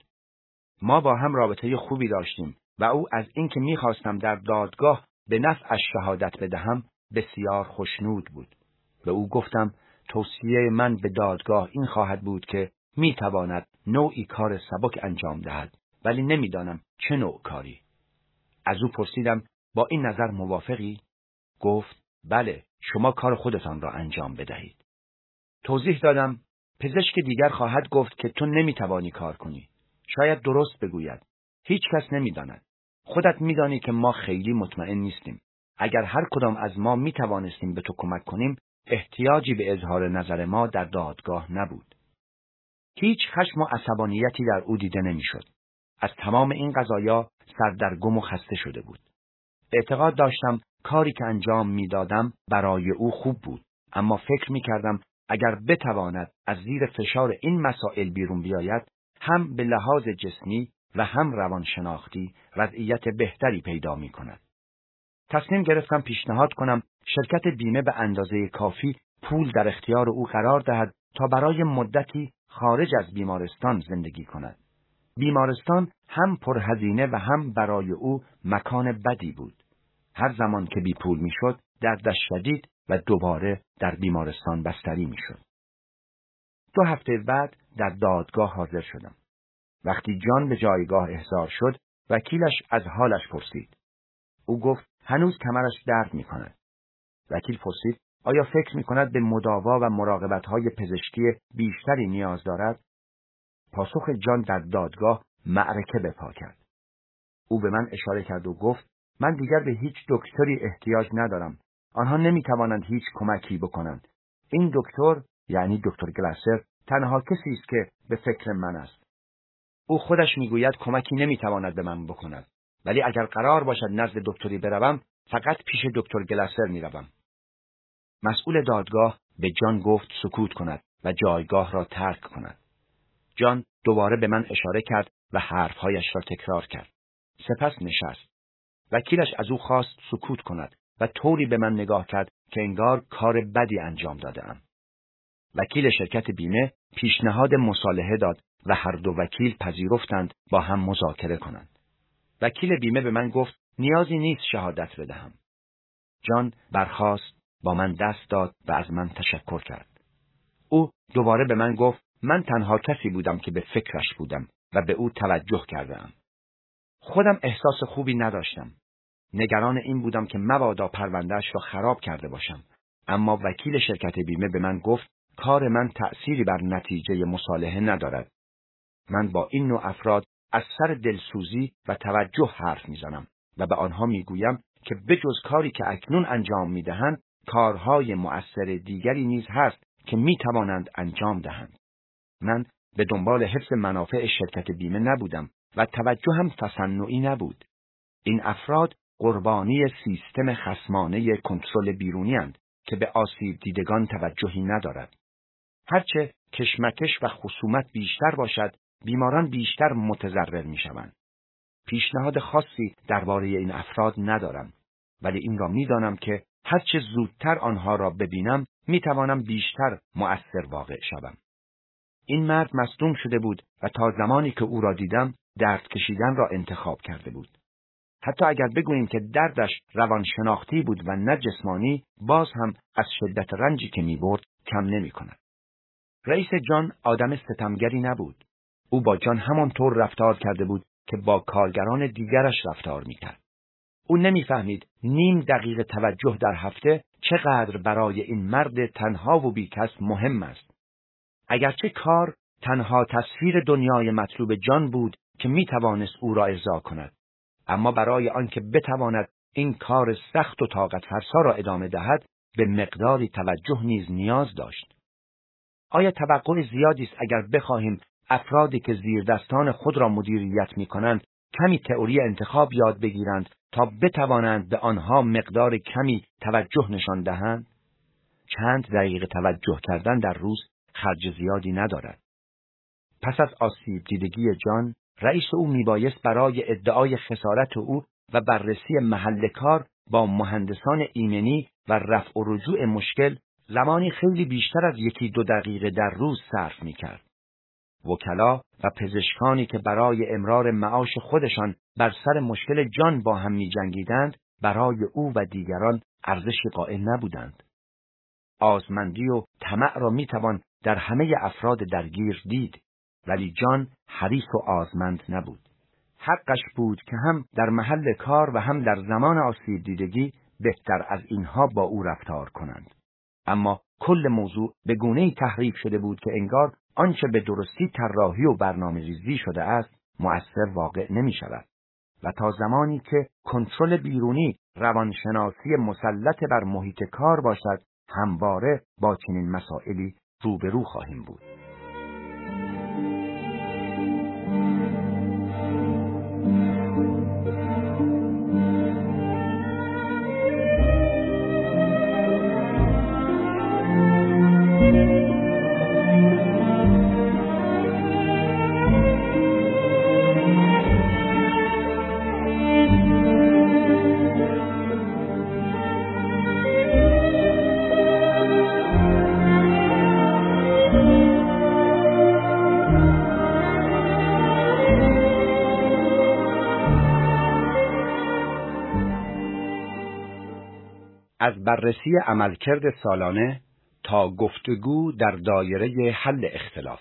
ما با هم رابطه خوبی داشتیم و او از اینکه می‌خواستم در دادگاه به نفعش شهادت بدهم بسیار خوشنود بود. به او گفتم توصیه من به دادگاه این خواهد بود که می‌تواند نوعی کار سبک انجام دهد، ولی نمی‌دانم چه نوع کاری. از او پرسیدم با این نظر موافقی؟ گفت بله، شما کار خودتان را انجام بدهید. توضیح دادم پزشک دیگر خواهد گفت که تو نمی‌توانی کار کنی. شاید درست بگوید. هیچ کس نمی‌داند. خودت می‌دانی که ما خیلی مطمئن نیستیم. اگر هر کدام از ما می‌توانستیم به تو کمک کنیم، احتیاجی به اظهار نظر ما در دادگاه نبود. هیچ خشم و عصبانیتی در او دیده نمی‌شد. از تمام این قضایا سردرگم و خسته شده بود. اعتقاد داشتم کاری که انجام می‌دادم برای او خوب بود، اما فکر می‌کردم اگر بتواند از زیر فشار این مسائل بیرون بیاید، هم به لحاظ جسمی و هم روانشناختی وضعیت بهتری پیدا می‌کند. تصمیم گرفتم پیشنهاد کنم شرکت بیمه به اندازه کافی پول در اختیار او قرار دهد تا برای مدتی خارج از بیمارستان زندگی کند. بیمارستان هم پرهزینه و هم برای او مکان بدی بود. هر زمان که بی پول می شد، دردش شدید و دوباره در بیمارستان بستری می شد. دو هفته بعد در دادگاه حاضر شدم. وقتی جان به جایگاه احضار شد، وکیلش از حالش پرسید. او گفت هنوز کمرش درد می کند. وکیل پرسید آیا فکر می کند به مداوا و مراقبت‌های پزشکی بیشتری نیاز دارد؟ پاسخ جان در دادگاه معرکه به پا کرد. او به من اشاره کرد و گفت من دیگر به هیچ دکتری احتیاج ندارم. آنها نمی توانند هیچ کمکی بکنند. این دکتر، یعنی دکتر گلاسر، تنها کسی است که به فکر من است. او خودش میگوید کمکی نمی تواند به من بکند. ولی اگر قرار باشد نزد دکتری بروم، فقط پیش دکتر گلاسر می روم. مسئول دادگاه به جان گفت سکوت کند و جایگاه را ترک کند. جان دوباره به من اشاره کرد و حرفهایش را تکرار کرد. سپس نشست. وکیلش از او خواست سکوت کند و طوری به من نگاه کرد که انگار کار بدی انجام داده‌ام. وکیل شرکت بیمه پیشنهاد مصالحه داد و هر دو وکیل پذیرفتند با هم مذاکره کنند. وکیل بیمه به من گفت نیازی نیست شهادت بدهم. جان برخاست، با من دست داد و از من تشکر کرد. او دوباره به من گفت من تنها کسی بودم که به فکرش بودم و به او توجه کردم. خودم احساس خوبی نداشتم. نگران این بودم که مبادا پرونده‌اش را خراب کرده باشم. اما وکیل شرکت بیمه به من گفت کار من تأثیری بر نتیجه مصالحه ندارد. من با این نوع افراد از سر دلسوزی و توجه حرف میزنم و به آنها میگویم که بجز کاری که اکنون انجام میدهند، کارهای مؤثر دیگری نیز هست که میتوانند انجام دهند. من به دنبال حفظ منافع شرکت بیمه نبودم و توجه هم تصنعی نبود. این افراد قربانی سیستم خصمانه کنترل بیرونی اند که به آسیب دیدگان توجهی ندارد. هرچه کشمکش و خصومت بیشتر باشد، بیماران بیشتر متضرر می‌شوند. پیشنهاد خاصی درباره این افراد ندارم، ولی این را می‌دانم که هرچه زودتر آنها را ببینم می‌توانم بیشتر مؤثر واقع شوم. این مرد مصدوم شده بود و تا زمانی که او را دیدم درد کشیدن را انتخاب کرده بود. حتی اگر بگوییم که دردش روانشناختی بود و نه جسمانی، باز هم از شدت رنجی که می‌برد کم نمی‌کند. رئیس جان آدم ستمگری نبود. او با جان همانطور رفتار کرده بود که با کارگران دیگرش رفتار می‌کرد. او نمی‌فهمید نیم دقیقه توجه در هفته چقدر برای این مرد تنها و بیکس مهم است. اگرچه کار تنها تصویر دنیای مطلوب جان بود که می‌توانست او را ارضا کند، اما برای آنکه بتواند این کار سخت و طاقت فرسا را ادامه دهد، به مقداری توجه نیز نیاز داشت. آیا توقع زیادی است اگر بخواهیم افرادی که زیر دستان خود را مدیریت می‌کنند کمی تئوری انتخاب یاد بگیرند تا بتوانند به آنها مقدار کمی توجه نشان دهند؟ چند دقیقه توجه کردن در روز خرج زیادی ندارد. پس از آسیب دیدگی جان، رئیس او میبایست برای ادعای خسارت او و بررسی محل کار با مهندسان ایمنی و رفع و رجوع مشکل زمانی خیلی بیشتر از یکی دو دقیقه در روز صرف میکرد. وکلا و پزشکانی که برای امرار معاش خودشان بر سر مشکل جان با هم می‌جنگیدند، برای او و دیگران ارزشی قائل نبودند. آزمندی و طمع را می‌توان در همه افراد درگیر دید، ولی جان حریص و آزمند نبود. حقش بود که هم در محل کار و هم در زمان آسیب دیدگی بهتر از اینها با او رفتار کنند. اما کل موضوع به گونه‌ای تحریف شده بود که انگار آنچه به درستی طراحی و برنامه‌ریزی شده است مؤثر واقع نمی‌شود و تا زمانی که کنترل بیرونی روانشناسی مسلط بر محیط کار باشد، همواره با چنین مسائلی روبرو خواهیم بود. از بررسی عملکرد سالانه تا گفتگو در دایره حل اختلاف.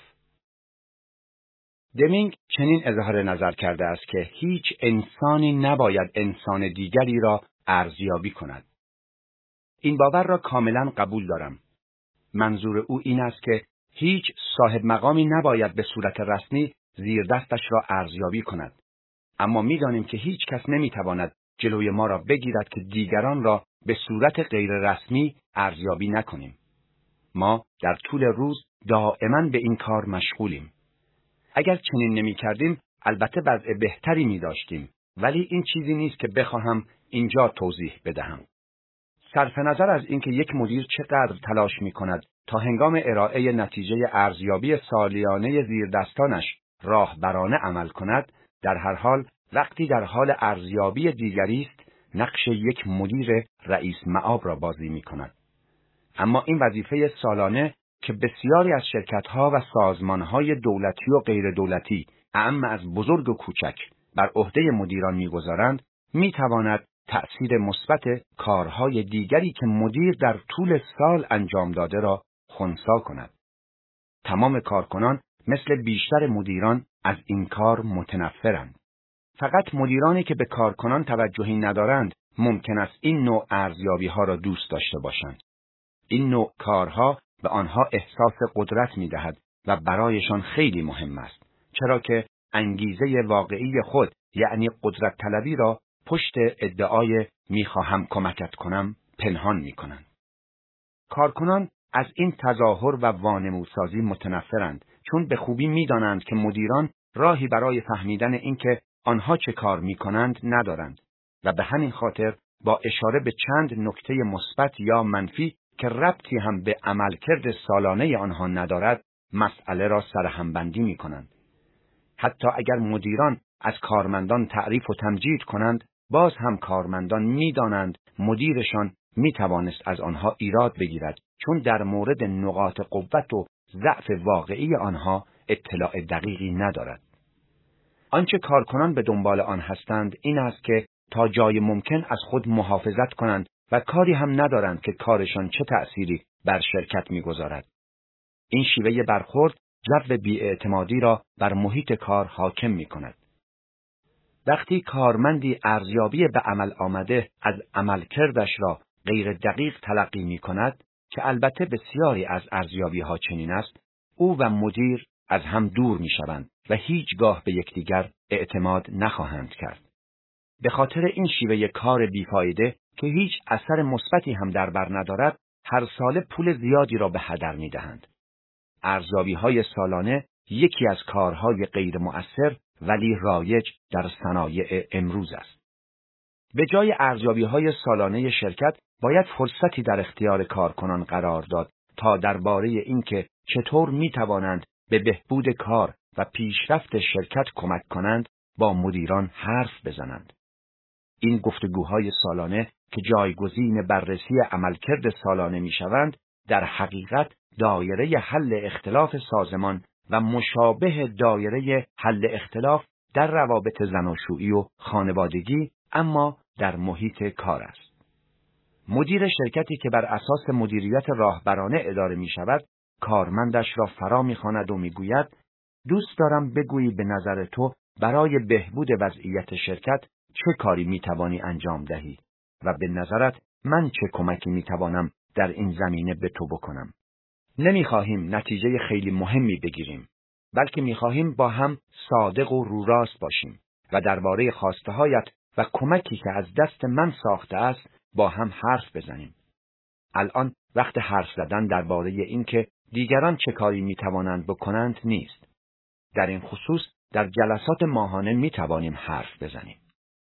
دمینگ چنین اظهار نظر کرده است که هیچ انسانی نباید انسان دیگری را ارزیابی کند. این باور را کاملا قبول دارم. منظور او این است که هیچ صاحب مقامی نباید به صورت رسمی زیر دستش را ارزیابی کند. اما می‌دانیم که هیچ کس نمی‌تواند جلوی ما را بگیرد که دیگران را به صورت غیر رسمی ارزیابی نکنیم. ما در طول روز دائما به این کار مشغولیم. اگر چنین نمی کردیم البته وضع بهتری می داشتیم، ولی این چیزی نیست که بخواهم اینجا توضیح بدهم. صرف نظر از اینکه یک مدیر چقدر تلاش می کند تا هنگام ارائه نتیجه ارزیابی سالیانه زیردستانش راهبرانه عمل کند، در هر حال وقتی در حال ارزیابی دیگری است، نقش یک مدیر رئیس مآب را بازی می کند. اما این وظیفه سالانه که بسیاری از شرکت‌ها و سازمان‌های دولتی و غیر دولتی، اعم از بزرگ و کوچک، بر عهده مدیران می‌گذارند، می‌تواند تأثیر مثبت کارهای دیگری که مدیر در طول سال انجام داده را خنثی کند. تمام کارکنان مثل بیشتر مدیران از این کار متنفرند. فقط مدیرانی که به کارکنان توجهی ندارند ممکن است این نوع ارزیابی‌ها را دوست داشته باشند. این نوع کارها به آنها احساس قدرت می‌دهد و برایشان خیلی مهم است، چرا که انگیزه واقعی خود یعنی قدرت طلبی را پشت ادعای می‌خواهم کمکت کنم پنهان می‌کنند. کارکنان از این تظاهر و وانمودسازی متنفرند، چون به خوبی می‌دانند که مدیران راهی برای فهمیدن اینکه آنها چه کار می‌کنند ندارند و به همین خاطر با اشاره به چند نکته مثبت یا منفی که ربطی هم به عملکرد سالانه آنها ندارد، مسئله را سرهمبندی می‌کنند. حتی اگر مدیران از کارمندان تعریف و تمجید کنند، باز هم کارمندان می‌دانند مدیرشان می‌توانست از آنها ایراد بگیرد، چون در مورد نقاط قوت و ضعف واقعی آنها اطلاع دقیقی ندارد. آنچه کارکنان به دنبال آن هستند این است که تا جای ممکن از خود محافظت کنند و کاری هم ندارند که کارشان چه تأثیری بر شرکت می‌گذارد. این شیوه برخورد جو بی‌اعتمادی را بر محیط کار حاکم می‌کند. وقتی کارمندی ارزیابی به عمل آمده از عملکردش را غیر دقیق تلقی می‌کند، که البته بسیاری از ارزیابی‌ها چنین است، او و مدیر از هم دور می‌شوند و هیچگاه به یکدیگر اعتماد نخواهند کرد. به خاطر این شیوه کار بیفایده که هیچ اثر مثبتی هم در بر ندارد، هر ساله پول زیادی را به هدر می‌دهند. ارزیابی‌های سالانه یکی از کارهای غیر مؤثر ولی رایج در صنایع امروز است. به جای ارزیابی‌های سالانه شرکت باید فرصتی در اختیار کارکنان قرار داد تا درباره اینکه چطور می‌توانند به بهبود کار و پیشرفت شرکت کمک کنند با مدیران حرف بزنند. این گفتگوهای سالانه که جایگزین بررسی عملکرد سالانه می‌شوند، در حقیقت دایره حل اختلاف سازمان و مشابه دایره حل اختلاف در روابط زناشویی و خانوادگی، اما در محیط کار است. مدیر شرکتی که بر اساس مدیریت راهبرانه اداره می شود، کارمندش را فرا می خواند و می گوید دوست دارم بگویی به نظر تو برای بهبود وضعیت شرکت چه کاری می توانی انجام دهی و به نظرت من چه کمکی می توانم در این زمینه به تو بکنم. نمی خواهیم نتیجه خیلی مهمی بگیریم، بلکه می خواهیم با هم صادق و رو راست باشیم و درباره خواسته هایت و کمکی که از دست من ساخته است با هم حرف بزنیم. الان وقت حرف زدن درباره این که دیگران چه کاری می توانند بکنند نیست. در این خصوص در جلسات ماهانه می توانیم حرف بزنیم.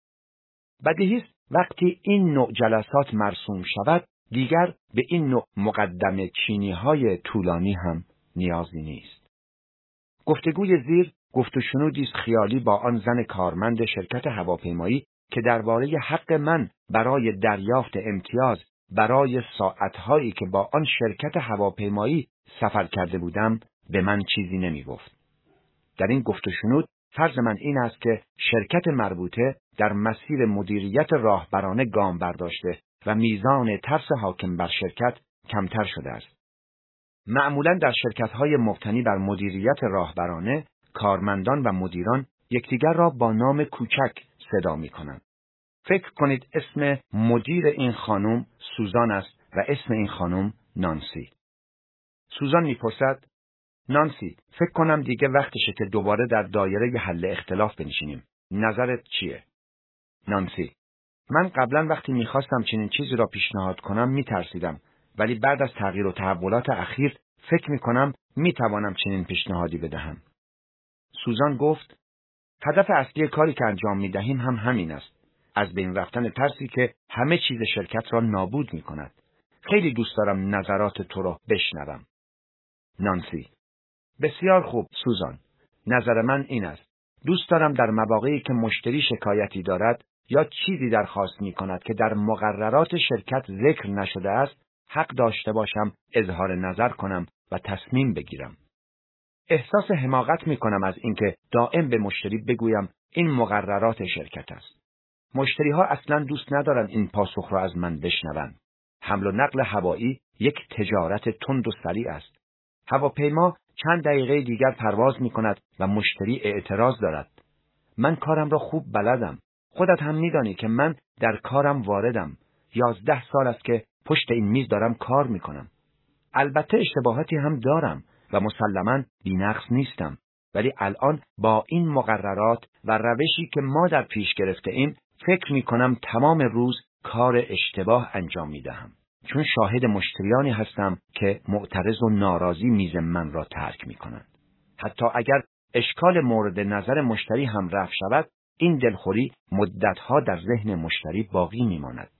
بدیهی است وقتی این نوع جلسات مرسوم شود، دیگر به این نوع مقدمه چینی های طولانی هم نیازی نیست. گفتگوی زیر گفت و شنودی است خیالی با آن زن کارمند شرکت هواپیمایی که درباره حق من برای دریافت امتیاز برای ساعتهایی که با آن شرکت هواپیمایی سفر کرده بودم به من چیزی نمی گفت. در این گفت و شنود فرض من این است که شرکت مربوطه در مسیر مدیریت راهبرانه گام برداشته و میزان ترس حاکم بر شرکت کمتر شده است. معمولاً در شرکت‌های مبتنی بر مدیریت راهبرانه، کارمندان و مدیران یکدیگر را با نام کوچک صدا می‌کنند. فکر کنید اسم مدیر این خانم سوزان است و اسم این خانم نانسی. سوزان می‌پرسد: نانسی، فکر کنم دیگه وقتشه که دوباره در دایره حل اختلاف بنشینیم. نظرت چیه؟ نانسی: من قبلا وقتی میخواستم چنین چیزی را پیشنهاد کنم میترسیدم، ولی بعد از تغییر و تحولات اخیر فکر میکنم میتوانم چنین پیشنهادی بدهم. سوزان گفت: هدف اصلی کاری که انجام میدهیم هم همین است. از بین رفتن ترسی که همه چیز شرکت را نابود میکند. خیلی دوست دارم نظرات تو را بشنوم. نانسی: بسیار خوب سوزان. نظر من این است. دوست دارم در مواقعی که مشتری شکایتی دارد یا چیزی درخواست می کند که در مقررات شرکت ذکر نشده است، حق داشته باشم اظهار نظر کنم و تصمیم بگیرم. احساس حماقت می کنم از اینکه دائم به مشتری بگویم این مقررات شرکت است. مشتری ها اصلاً دوست ندارند این پاسخ را از من بشنوند. حمل و نقل هوایی یک تجارت تند و سریع است. هواپیما چند دقیقه دیگر پرواز می کند و مشتری اعتراض دارد. من کارم را خوب بلدم. خودت هم می دانی که من در کارم واردم. یازده سال است که پشت این میز دارم کار می کنم. البته اشتباهاتی هم دارم و مسلماً بی‌نقص نیستم. ولی الان با این مقررات و روشی که ما در پیش گرفته ایم فکر می کنم تمام روز کار اشتباه انجام می دهم. چون شاهد مشتریانی هستم که معترض و ناراضی میز من را ترک می کنند. حتی اگر اشکال مورد نظر مشتری هم رفع شود، این دلخوری مدتها در ذهن مشتری باقی میماند.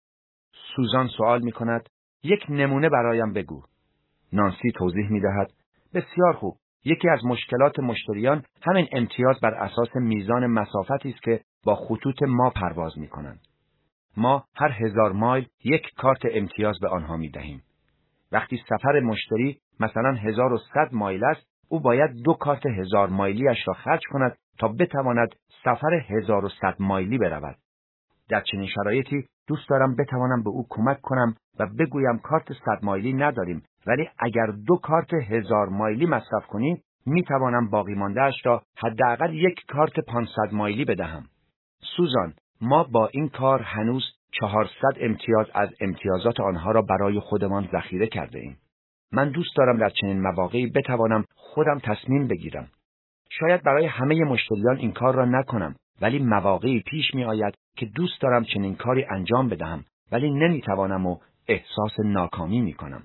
سوزان سوال میکند: یک نمونه برایم بگو. نانسی توضیح میدهد: بسیار خوب. یکی از مشکلات مشتریان همین امتیاز بر اساس میزان مسافتی است که با خطوط ما پرواز میکنند. ما هر هزار مایل یک کارت امتیاز به آنها میدهیم. وقتی سفر مشتری مثلا هزار و صد مایل است، او باید دو کارت هزار مایلیش را خرج کند تا بتواند سفر هزار و صد مایلی برود. در چنین شرایطی دوست دارم بتوانم به او کمک کنم و بگویم کارت صد مایلی نداریم، ولی اگر دو کارت هزار مایلی مصرف کنی، می توانم باقی مانده اش را حداقل یک کارت پانصد مایلی بدهم. سوزان، ما با این کار هنوز چهارصد امتیاز از امتیازات آنها را برای خودمان ذخیره کرده ایم. من دوست دارم در چنین مواقعی بتوانم خودم تصمیم بگیرم. شاید برای همه مشتریان این کار را نکنم، ولی مواقعی پیش می آید که دوست دارم چنین کاری انجام بدهم، ولی نمی توانم و احساس ناکامی می کنم.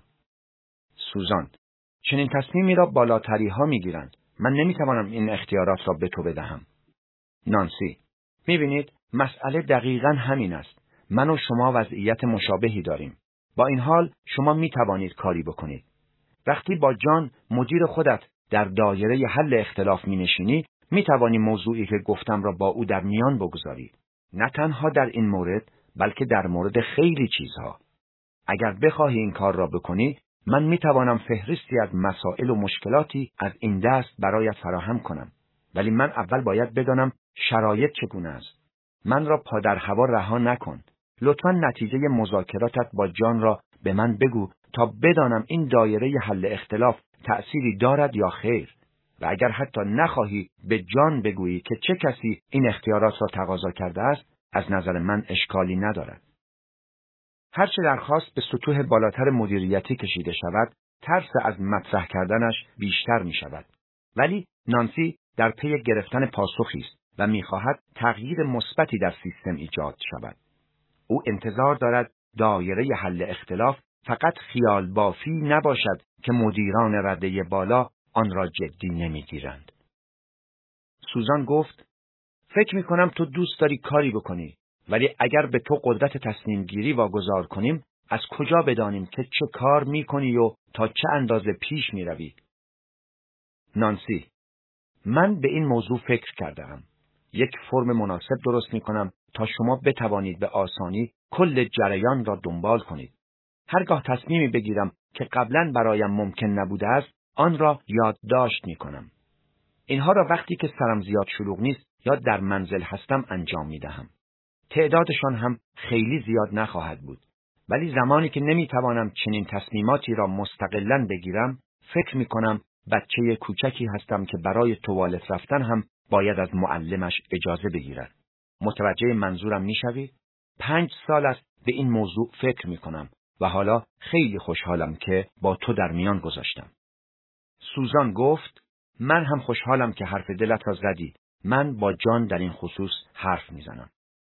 سوزان، چنین تصمیمی را بالاتری ها می گیرند. من نمی توانم این اختیارات را به تو بدهم. نانسی، می بینید مسئله دقیقاً همین است. من و شما وضعیت مشابهی داریم. با این حال شما می توانید کاری بکنید. وقتی با جان مدیر خودت در دایره حل اختلاف می نشینی، می توانی موضوعی که گفتم را با او در میان بگذاری. نه تنها در این مورد، بلکه در مورد خیلی چیزها. اگر بخواهی این کار را بکنی، من می توانم فهرستی از مسائل و مشکلاتی از این دست برایت فراهم کنم. ولی من اول باید بدانم شرایط چگونه است. من را پادر هوا رها نکن. لطفاً نتیجه مذاکراتت با جان را به من بگو تا بدانم این دایره حل اختلاف تأثیری دارد یا خیر. و اگر حتی نخواهی به جان بگویی که چه کسی این اختیارات را تقاضا کرده است، از نظر من اشکالی ندارد. هرچه درخواست به سطوح بالاتر مدیریتی کشیده شود، ترس از مطرح کردنش بیشتر می شود. ولی نانسی در پی گرفتن پاسخی است و می خواهد تغییر مثبتی در سیستم ایجاد شود. او انتظار دارد دایره حل اختلاف فقط خیال بافی نباشد که مدیران رده بالا آن را جدی نمیگیرند. سوزان گفت: فکر می کنم تو دوست داری کاری بکنی، ولی اگر به تو قدرت تصمیم گیری واگذار کنیم، از کجا بدانیم که چه کار می کنی و تا چه اندازه پیش می روی؟ نانسی: من به این موضوع فکر کردم. یک فرم مناسب درست می کنم تا شما بتوانید به آسانی کل جریان را دنبال کنید. هرگاه تصمیمی بگیرم که قبلا برایم ممکن نبوده است، آن را یادداشت می کنم. اینها را وقتی که سرم زیاد شلوغ نیست یا در منزل هستم انجام می دهم. تعدادشان هم خیلی زیاد نخواهد بود. ولی زمانی که نمی توانم چنین تصمیماتی را مستقلاً بگیرم، فکر می کنم بچه کوچکی هستم که برای توالت رفتن هم باید از معلمش اجازه بگیرد. متوجه منظورم می شوی؟ پنج سال است به این موضوع فکر می کنم و حالا خیلی خوشحالم که با تو در میان گذاشتم. سوزان گفت: من هم خوشحالم که حرف دلت را زدی. من با جان در این خصوص حرف می زنم.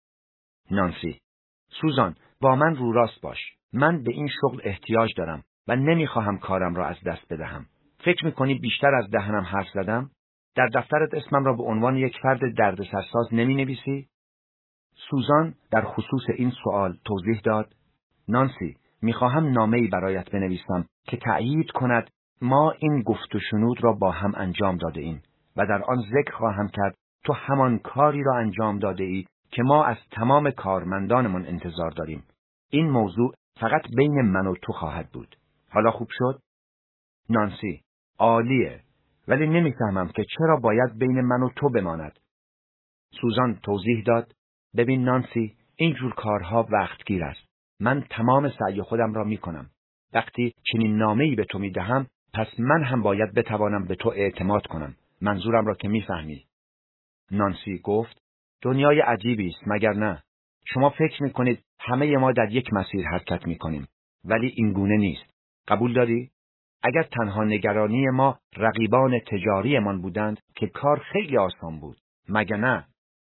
نانسی: سوزان، با من رو راست باش. من به این شغل احتیاج دارم و نمی خواهم کارم را از دست بدهم. فکر می کنی بیشتر از دهنم حرف زدم؟ در دفترت اسمم را به عنوان یک فرد دردسرساز نمی نویسی؟ سوزان در خصوص این سوال توضیح داد: نانسی، می خواهم نامه‌ای برایت بنویسم که تأیید کند ما این گفت و شنود را با هم انجام داده ایم و در آن ذکر خواهم کرد تو همان کاری را انجام داده ای که ما از تمام کارمندانمان انتظار داریم. این موضوع فقط بین من و تو خواهد بود. حالا خوب شد؟ نانسی: عالیه، ولی نمیفهمم که چرا باید بین من و تو بماند. سوزان توضیح داد: ببین نانسی، این جور کارها وقتگیر است. من تمام سعی خودم را میکنم. وقتی چنین نامه‌ای به تو میدهم، پس من هم باید بتوانم به تو اعتماد کنم. منظورم را که میفهمی. نانسی گفت: دنیای عجیبی است، مگر نه؟ شما فکر میکنید همه ما در یک مسیر حرکت میکنیم، ولی این گونه نیست. قبول داری؟ اگر تنها نگرانی ما رقیبان تجاریمان بودند که کار خیلی آسان بود، مگر نه؟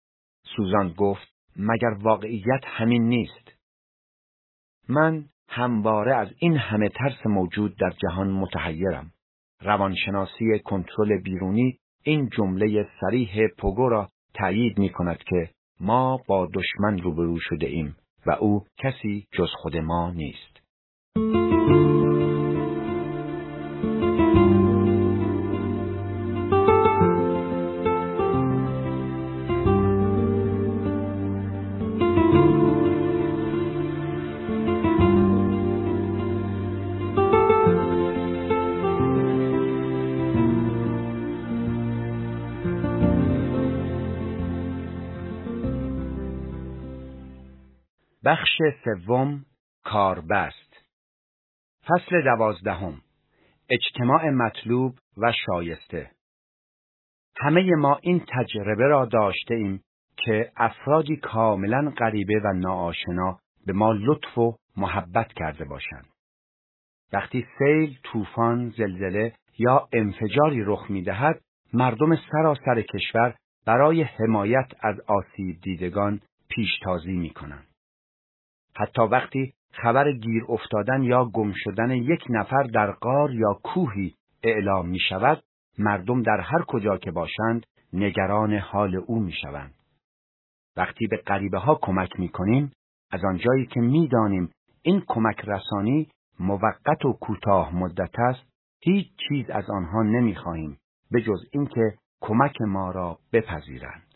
سوزان گفت: مگر واقعیت همین نیست؟ من همواره از این همه ترس موجود در جهان متحیرم. روانشناسی کنترل بیرونی این جمله صریح پوگو را تأیید می کند که ما با دشمن روبرو شده ایم و او کسی جز خود ما نیست. بخش سوم، کاربست. فصل دوازدهم، اجتماع مطلوب و شایسته. همه ما این تجربه را داشته ایم که افرادی کاملا غریبه و ناآشنا به ما لطف و محبت کرده باشند. وقتی سیل، طوفان، زلزله یا انفجاری رخ می‌دهد، مردم سراسر کشور برای حمایت از آسیب دیدگان پیشتازی می‌کنند. حتی وقتی خبر گیر افتادن یا گم شدن یک نفر در غار یا کوهی اعلام می شود، مردم در هر کجا که باشند نگران حال او می شوند. وقتی به غریبه ها کمک می کنیم، از آنجایی که می دانیم این کمک رسانی موقت و کوتاه مدت است، هیچ چیز از آنها نمی خواهیم به جز اینکه کمک ما را بپذیرند.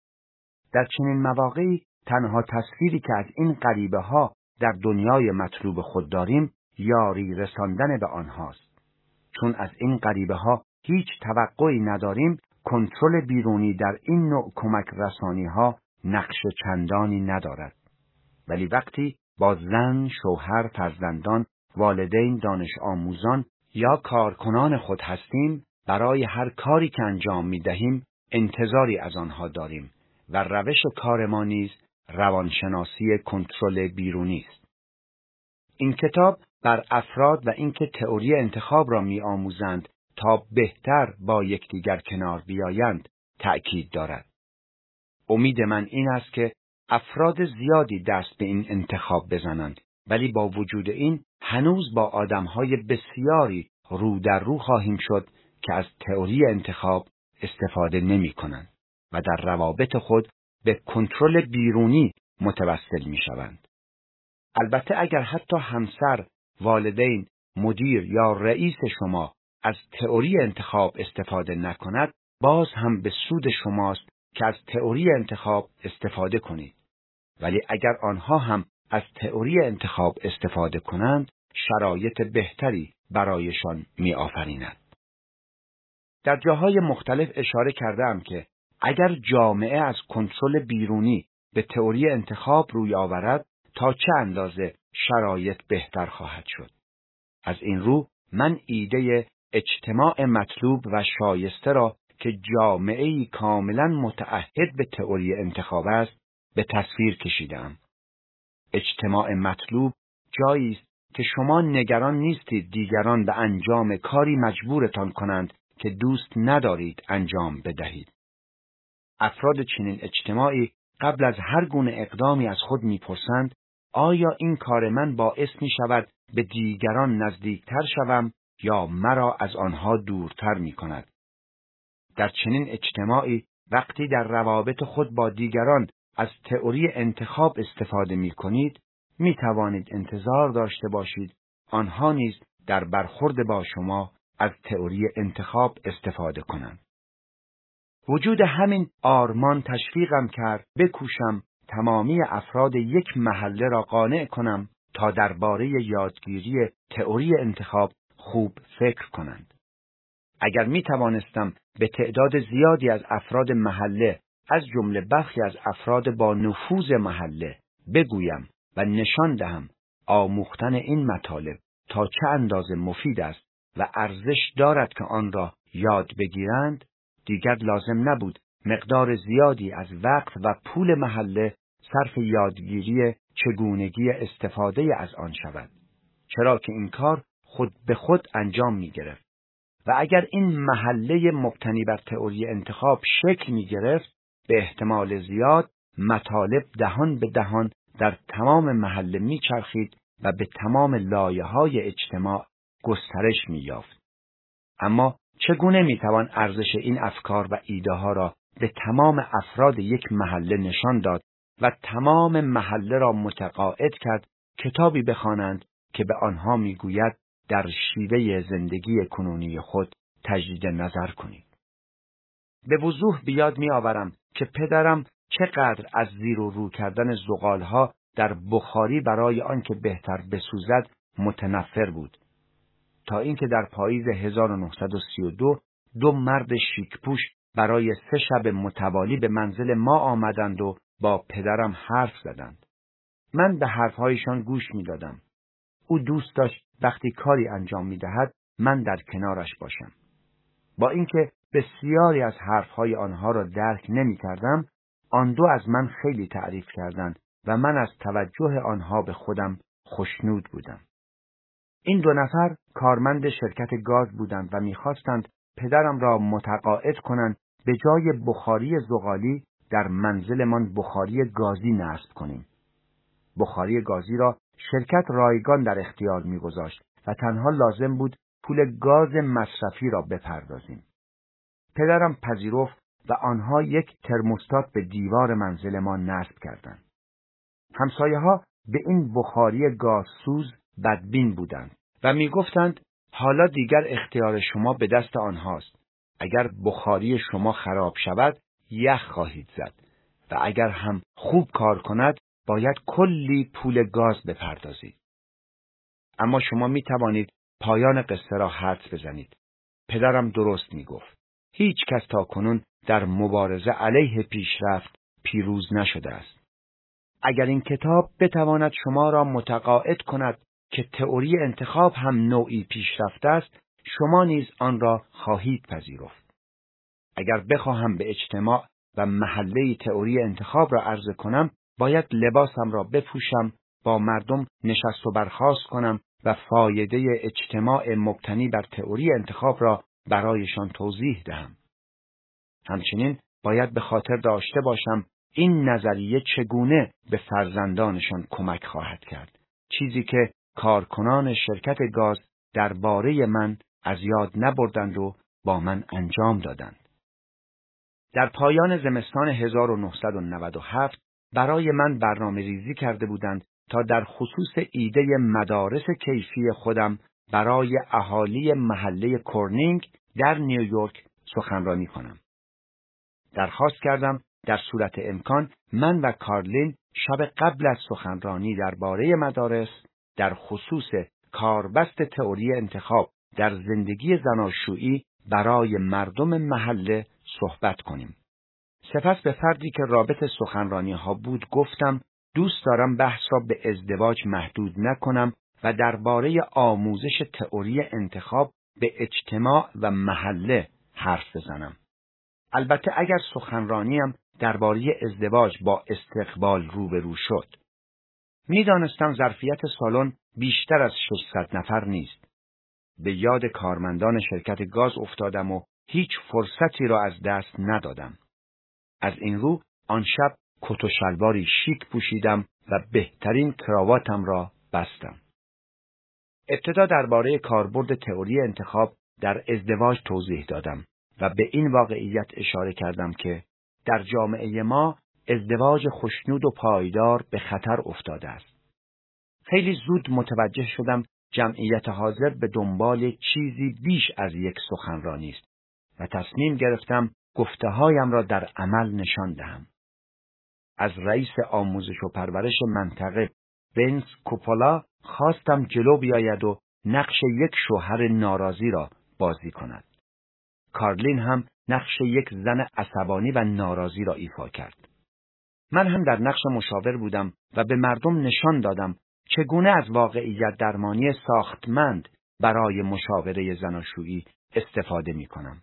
در چنین مواقعی تنها تصویری که از این غریبه ها در دنیای مطلوب خود داریم یاری رساندن به آنهاست. چون از این غریبه ها هیچ توقعی نداریم، کنترل بیرونی در این نوع کمک رسانی ها نقش چندانی ندارد. ولی وقتی با زن، شوهر، فرزندان، والدین، دانش آموزان یا کارکنان خود هستیم، برای هر کاری که انجام می دهیم انتظاری از آنها داریم و روش کار ما نیز روانشناسی کنترل بیرونی است. این کتاب بر افراد و اینکه تئوری انتخاب را می‌آموزند تا بهتر با یکدیگر کنار بیایند تأکید دارد. امید من این است که افراد زیادی دست به این انتخاب بزنند، ولی با وجود این هنوز با آدم‌های بسیاری رو در رو خواهیم شد که از تئوری انتخاب استفاده نمی‌کنند و در روابط خود به کنترل بیرونی متوسل می‌شوند. البته اگر حتی همسر، والدین، مدیر یا رئیس شما از تئوری انتخاب استفاده نکند، باز هم به سود شماست که از تئوری انتخاب استفاده کنید. ولی اگر آنها هم از تئوری انتخاب استفاده کنند، شرایط بهتری برایشان می‌آفریند. در جاهای مختلف اشاره کردم که اگر جامعه از کنترل بیرونی به تئوری انتخاب روی آورد، تا چه اندازه شرایط بهتر خواهد شد. از این رو من ایده اجتماع مطلوب و شایسته را که جامعه‌ای کاملا متعهد به تئوری انتخاب است به تصویر کشیدم. اجتماع مطلوب جایی است که شما نگران نیستید دیگران به انجام کاری مجبورتان کنند که دوست ندارید انجام بدهید. افراد چنین اجتماعی قبل از هر گونه اقدامی از خود میپرسند آیا این کار من باعث می شود به دیگران نزدیکتر شوم یا مرا از آنها دورتر می کند؟ در چنین اجتماعی وقتی در روابط خود با دیگران از تئوری انتخاب استفاده می کنید، می توانید انتظار داشته باشید آنها نیز در برخورد با شما از تئوری انتخاب استفاده کنند. وجود همین آرمان تشویقم کرد بکوشم تمامی افراد یک محله را قانع کنم تا درباره یادگیری تئوری انتخاب خوب فکر کنند. اگر می توانستم به تعداد زیادی از افراد محله از جمله برخی از افراد با نفوذ محله بگویم و نشان دهم آموختن این مطالب تا چه اندازه مفید است و ارزش دارد که آن را یاد بگیرند، دیگر لازم نبود مقدار زیادی از وقت و پول محله صرف یادگیری چگونگی استفاده از آن شود، چرا که این کار خود به خود انجام می گرفت. و اگر این محله مبتنی بر تئوری انتخاب شکل می گرفت، به احتمال زیاد مطالب دهان به دهان در تمام محله می چرخید و به تمام لایه‌های اجتماع گسترش می یافت. اما چگونه میتوان ارزش این افکار و ایده ها را به تمام افراد یک محله نشان داد و تمام محله را متقاعد کرد کتابی بخوانند که به آنها میگوید در شیوه زندگی کنونی خود تجدید نظر کنید. به وضوح بیاد می آورم که پدرم چقدر از زیر و رو کردن زغالها در بخاری برای آنکه بهتر بسوزد متنفر بود، تا اینکه در پاییز هزار و نهصد و سی و دو دو مرد شیکپوش برای سه شب متوالی به منزل ما آمدند و با پدرم حرف زدند. من به حرفهایشان گوش می دادم. او دوست داشت وقتی کاری انجام می دهد من در کنارش باشم. با اینکه بسیاری از حرفهای آنها را درک نمی کردم، آن دو از من خیلی تعریف کردند و من از توجه آنها به خودم خوشنود بودم. این دو نفر کارمند شرکت گاز بودند و می‌خواستند پدرم را متقاعد کنند به جای بخاری زغالی در منزلمان بخاری گازی نصب کنیم. بخاری گازی را شرکت رایگان در اختیار می‌گذاشت و تنها لازم بود پول گاز مصرفی را بپردازیم. پدرم پذیرفت و آنها یک ترموستات به دیوار منزل ما نصب کردند. همسایه‌ها به این بخاری گازسوز بدبین بودند و می‌گفتند حالا دیگر اختیار شما به دست آنهاست. اگر بخاری شما خراب شود یخ خواهید زد و اگر هم خوب کار کند باید کلی پول گاز بپردازید. اما شما می توانید پایان قصه را حدس بزنید. پدرم درست می گفت. هیچ کس تا کنون در مبارزه علیه پیشرفت پیروز نشده است. اگر این کتاب بتواند شما را متقاعد کند که تئوری انتخاب هم نوعی پیشرفت است، شما نیز آن را خواهید پذیرفت. اگر بخواهم به اجتماع و محله تئوری انتخاب را عرضه کنم، باید لباسم را بپوشم، با مردم نشست و برخاست کنم و فایده اجتماع مبتنی بر تئوری انتخاب را برایشان توضیح دهم. همچنین باید به خاطر داشته باشم این نظریه چگونه به فرزندانشان کمک خواهد کرد، چیزی که کارکنان شرکت گاز درباره من از یاد نبردند و با من انجام دادند. در پایان زمستان هزار و نهصد و نود و هفت برای من برنامه ریزی کرده بودند تا در خصوص ایده مدارس کیفی خودم برای اهالی محله کورنینگ در نیویورک سخنرانی کنم. درخواست کردم در صورت امکان من و کارلین شب قبل از سخنرانی درباره مدارس در خصوص کاربست تئوری انتخاب در زندگی زناشویی برای مردم محله صحبت کنیم. سپس به فردی که رابط سخنرانی ها بود گفتم دوست دارم بحث را به ازدواج محدود نکنم و درباره آموزش تئوری انتخاب به اجتماع و محله حرف بزنم. البته اگر سخنرانیم درباره ازدواج با استقبال روبرو شد. می‌دانستم ظرفیت سالن بیشتر از ششصد نفر نیست. به یاد کارمندان شرکت گاز افتادم و هیچ فرصتی را از دست ندادم. از این رو آن شب کت و شلواری شیک پوشیدم و بهترین کراواتم را بستم. ابتدا درباره کاربرد تئوری انتخاب در ازدواج توضیح دادم و به این واقعیت اشاره کردم که در جامعه ما ازدواج خوشنود و پایدار به خطر افتاده است. خیلی زود متوجه شدم جمعیت حاضر به دنبال چیزی بیش از یک سخنرانی است و تصمیم گرفتم گفته‌هایم را در عمل نشان دهم. از رئیس آموزش و پرورش منطقه وینس کوپولا خواستم جلو بیاید و نقش یک شوهر ناراضی را بازی کند. کارلین هم نقش یک زن عصبانی و ناراضی را ایفا کرد. من هم در نقش مشاور بودم و به مردم نشان دادم چگونه از واقعیت درمانی ساختمند برای مشاوره زناشویی استفاده می کنم.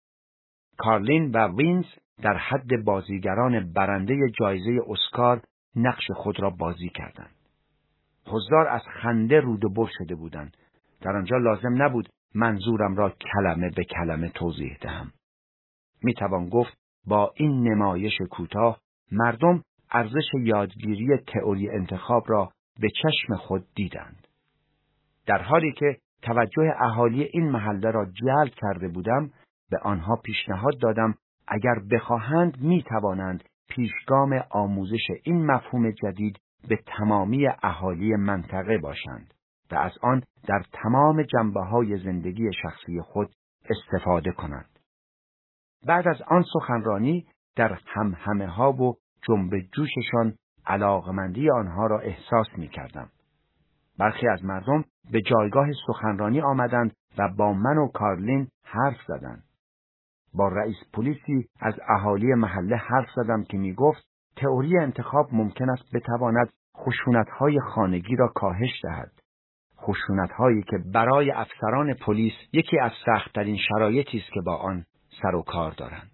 کارلین و وینز در حد بازیگران برنده جایزه اسکار نقش خود را بازی کردند. حضار از خنده رود و بر شده بودند. در آنجا لازم نبود منظورم را کلمه به کلمه توضیح دهم. می توان گفت با این نمایش کوتاه مردم ارزش یادگیری تئوری انتخاب را به چشم خود دیدند. در حالی که توجه اهالی این محله را جلب کرده بودم، به آنها پیشنهاد دادم اگر بخواهند می توانند پیشگام آموزش این مفهوم جدید به تمامی اهالی منطقه باشند و از آن در تمام جنبه‌های زندگی شخصی خود استفاده کنند. بعد از آن سخنرانی در همهمه ها و جنب جوششان علاقمندی آنها را احساس می کردم. برخی از مردم به جایگاه سخنرانی آمدند و با من و کارلین حرف زدند. با رئیس پلیسی از اهالی محله حرف زدم که می گفت تئوری انتخاب ممکن است بتواند خشونت‌های خانگی را کاهش دهد. خشونت‌هایی که برای افسران پلیس یکی از سخت‌ترین شرایطی است که با آن سر و کار دارند.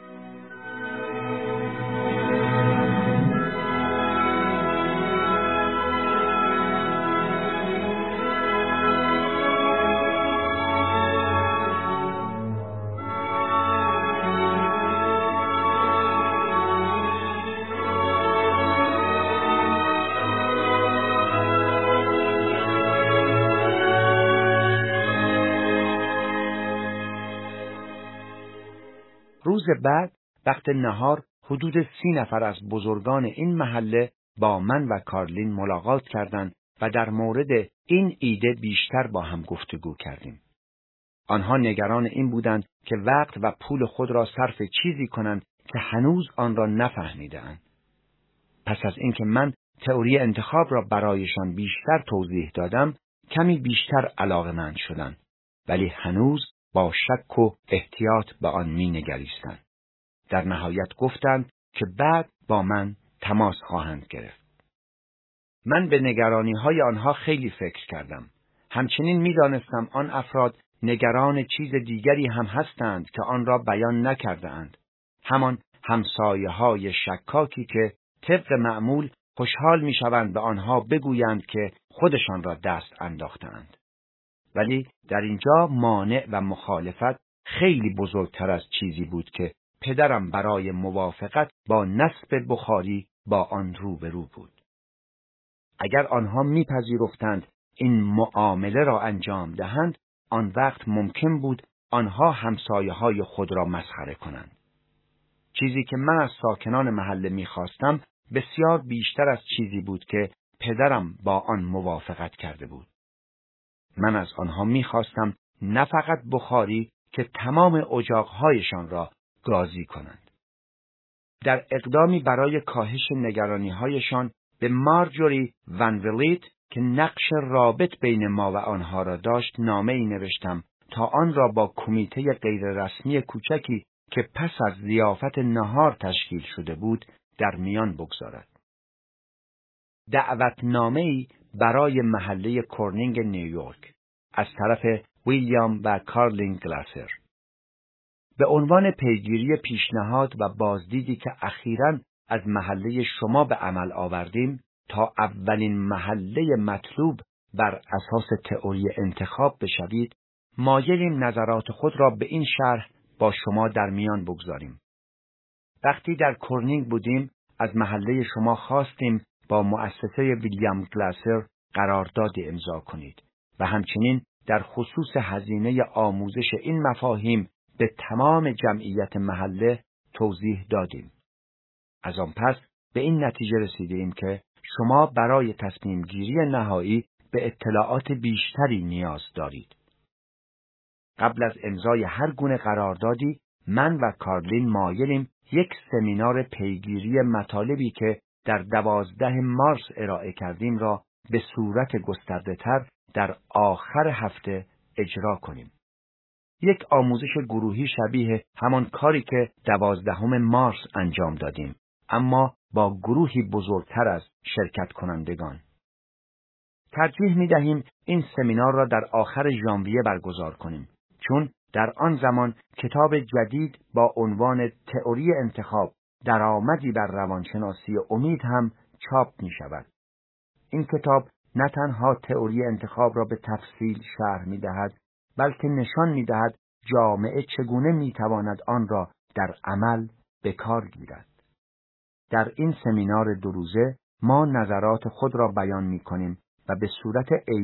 روز بعد وقت نهار حدود سی نفر از بزرگان این محله با من و کارلین ملاقات کردند و در مورد این ایده بیشتر با هم گفتگو کردیم. آنها نگران این بودند که وقت و پول خود را صرف چیزی کنند که هنوز آن را نفهمیدند. پس از اینکه من تئوری انتخاب را برایشان بیشتر توضیح دادم، کمی بیشتر علاقه‌مند شدند، ولی هنوز با شک و احتیاط به آن می نگریستند. در نهایت گفتند که بعد با من تماس خواهند گرفت. من به نگرانی های آنها خیلی فکر کردم. همچنین می دانستم آن افراد نگران چیز دیگری هم هستند که آن را بیان نکرده اند. همان همسایه های شکاکی که طبق معمول خوشحال می شوند به آنها بگویند که خودشان را دست انداختند. ولی در اینجا مانع و مخالفت خیلی بزرگتر از چیزی بود که پدرم برای موافقت با نصب بخاری با آن روبرو بود. اگر آنها میپذیرفتند این معامله را انجام دهند، آن وقت ممکن بود آنها همسایه‌های خود را مسخره کنند. چیزی که من از ساکنان محله میخواستم بسیار بیشتر از چیزی بود که پدرم با آن موافقت کرده بود. من از آنها میخواستم نه فقط بخاری که تمام اجاقهایشان را گازی کنند. در اقدامی برای کاهش نگرانی‌هایشان به مارجوری ون ولیت که نقش رابط بین ما و آنها را داشت نامه‌ای نوشتم تا آن را با کمیته غیررسمی کوچکی که پس از ضیافت نهار تشکیل شده بود در میان بگذارد. دعوتنامه‌ای برای محله کورنینگ نیویورک از طرف ویلیام و کارلین گلاسر به عنوان پیگیری پیشنهاد و بازدیدی که اخیراً از محله شما به عمل آوردیم تا اولین محله مطلوب بر اساس تئوری انتخاب بشوید، مایلیم نظرات خود را به این شرح با شما در میان بگذاریم. وقتی در کورنینگ بودیم از محله شما خواستیم با مؤسسه ویلیام گلاسر قراردادی امضا کنید و همچنین در خصوص هزینه آموزش این مفاهیم به تمام جمعیت محله توضیح دادیم. از آن پس به این نتیجه رسیدیم که شما برای تصمیم گیری نهایی به اطلاعات بیشتری نیاز دارید. قبل از امضای هر گونه قراردادی، من و کارلین مایلیم یک سمینار پیگیری مطالبی که در دوازده مارس ارائه کردیم را به صورت گسترده‌تر در آخر هفته اجرا کنیم. یک آموزش گروهی شبیه همان کاری که دوازدهم مارس انجام دادیم، اما با گروهی بزرگتر از شرکت کنندگان. ترجیح می دهیم این سمینار را در آخر ژانویه برگزار کنیم، چون در آن زمان کتاب جدید با عنوان تئوری انتخاب درآمدی بر روانشناسی امید هم چاپ می شود. این کتاب نه تنها تئوری انتخاب را به تفصیل شرح می دهد، بلکه نشان می دهد جامعه چگونه می تواند آن را در عمل به کار گیرد. در این سمینار دو روزه ما نظرات خود را بیان می کنیم و به صورت عینی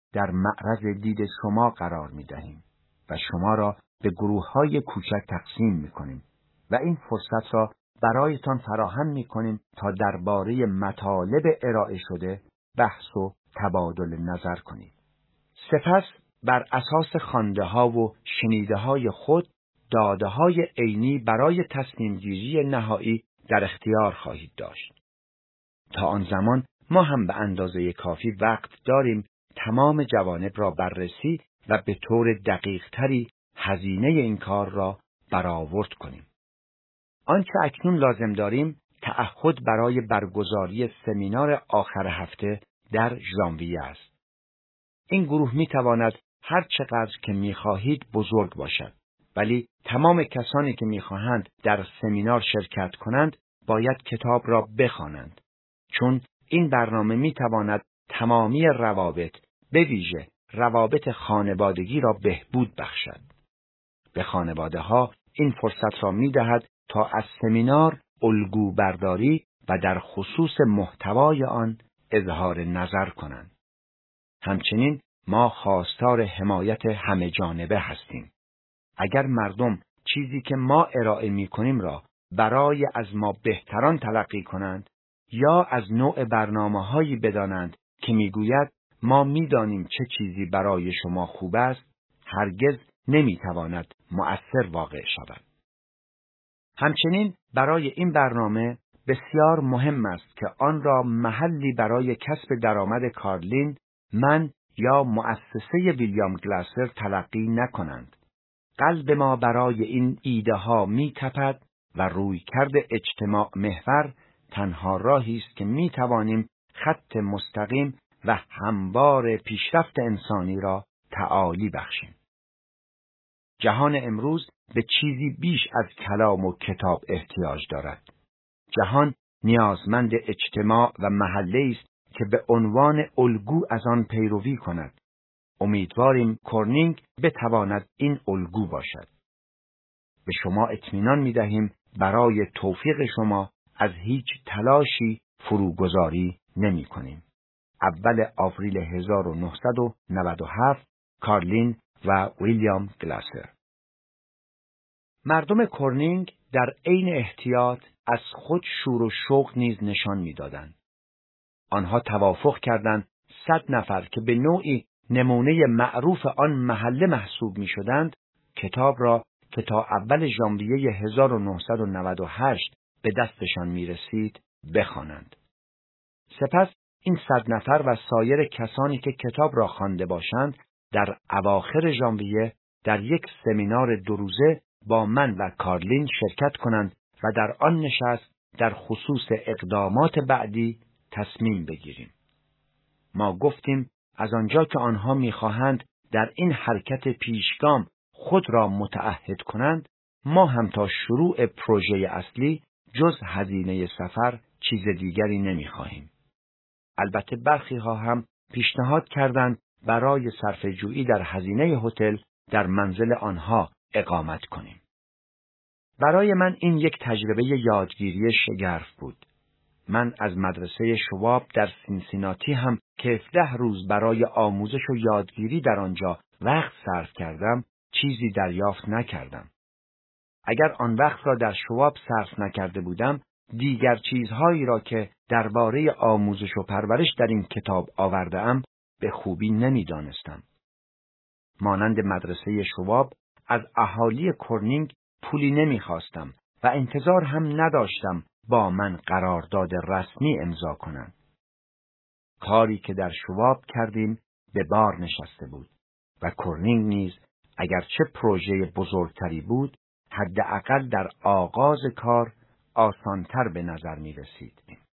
در معرض دید شما قرار می دهیم و شما را به گروه های کوچک تقسیم می کنیم و این فرصت را برایتان فراهم می کنیم تا درباره مطالب ارائه شده بحث و تبادل نظر کنید. سپس بر اساس خوانده ها و شنیده های خود داده های عینی برای تصمیم گیری نهایی در اختیار خواهید داشت. تا آن زمان ما هم به اندازه کافی وقت داریم تمام جوانب را بررسی و به طور دقیق تری هزینه این کار را برآورد کنیم. آنچه اکنون لازم داریم تعهد برای برگزاری سمینار آخر هفته در ژانویه است. این گروه می تواند هر چقدر که می خواهید بزرگ باشد، ولی تمام کسانی که می خواهند در سمینار شرکت کنند باید کتاب را بخوانند، چون این برنامه می تواند تمامی روابط، به ویژه روابط خانوادگی را بهبود بخشد. به خانواده ها این فرصت را می دهد تا از سمینار الگو برداری و در خصوص محتوای آن اظهار نظر کنند. همچنین ما خواستار حمایت همه جانبه هستیم. اگر مردم چیزی که ما ارائه می کنیم را برای از ما بهتران تلقی کنند یا از نوع برنامه‌هایی بدانند که میگوید ما میدانیم چه چیزی برای شما خوب است، هرگز نمیتواند مؤثر واقع شود. همچنین برای این برنامه بسیار مهم است که آن را محلی برای کسب درآمد کارلین، من یا مؤسسه ویلیام گلاسر تلقی نکنند. قلب ما برای این ایده ها می تپد و رویکرد اجتماع محور تنها راهی است که می توانیم خط مستقیم و هموار پیشرفت انسانی را تعالی بخشیم. جهان امروز به چیزی بیش از کلام و کتاب احتیاج دارد. جهان نیازمند اجتماع و محله است که به عنوان الگو از آن پیروی کند. امیدواریم کورنینگ بتواند این الگو باشد. به شما اطمینان می دهیم برای توفیق شما از هیچ تلاشی فروگذاری نمی کنیم. اول آوریل هزار و نهصد و نود و هفت، کارلین و ویلیام گلاسر. مردم کورنینگ در عین احتیاط از خود شور و شوق نیز نشان می‌دادند. آنها توافق کردند صد نفر که به نوعی نمونه معروف آن محله محسوب می‌شدند، کتاب را که تا اول ژانویه هزار و نهصد و نود و هشت به دستشان می‌رسید بخوانند. سپس این صد نفر و سایر کسانی که کتاب را خوانده باشند در اواخر ژانویه در یک سمینار دو روزه با من و کارلین شرکت کنند و در آن نشست در خصوص اقدامات بعدی تصمیم بگیریم. ما گفتیم از آنجا که آنها می‌خواهند در این حرکت پیشگام خود را متعهد کنند، ما هم تا شروع پروژه اصلی جز هزینه سفر چیز دیگری نمی‌خواهیم. البته برخی ها هم پیشنهاد کردند برای صرفه‌جویی در هزینه هتل در منزل آنها اقامت کنیم. برای من این یک تجربه یادگیری شگرف بود. من از مدرسه شواب در سینسیناتی هم که هفده روز برای آموزش و یادگیری در آنجا وقت صرف کردم، چیزی دریافت نکردم. اگر آن وقت را در شواب صرف نکرده بودم، دیگر چیزهایی را که درباره آموزش و پرورش در این کتاب آورده‌ام به خوبی نمی‌دانستم. مانند مدرسه شواب از اهالی کورنینگ پولی نمی‌خواستم و انتظار هم نداشتم با من قرارداد رسمی امضا کنند. کاری که در شواب کردیم به بار نشسته بود و کورنینگ نیز اگرچه پروژه بزرگتری بود، حداقل در آغاز کار آسانتر به نظر می رسید.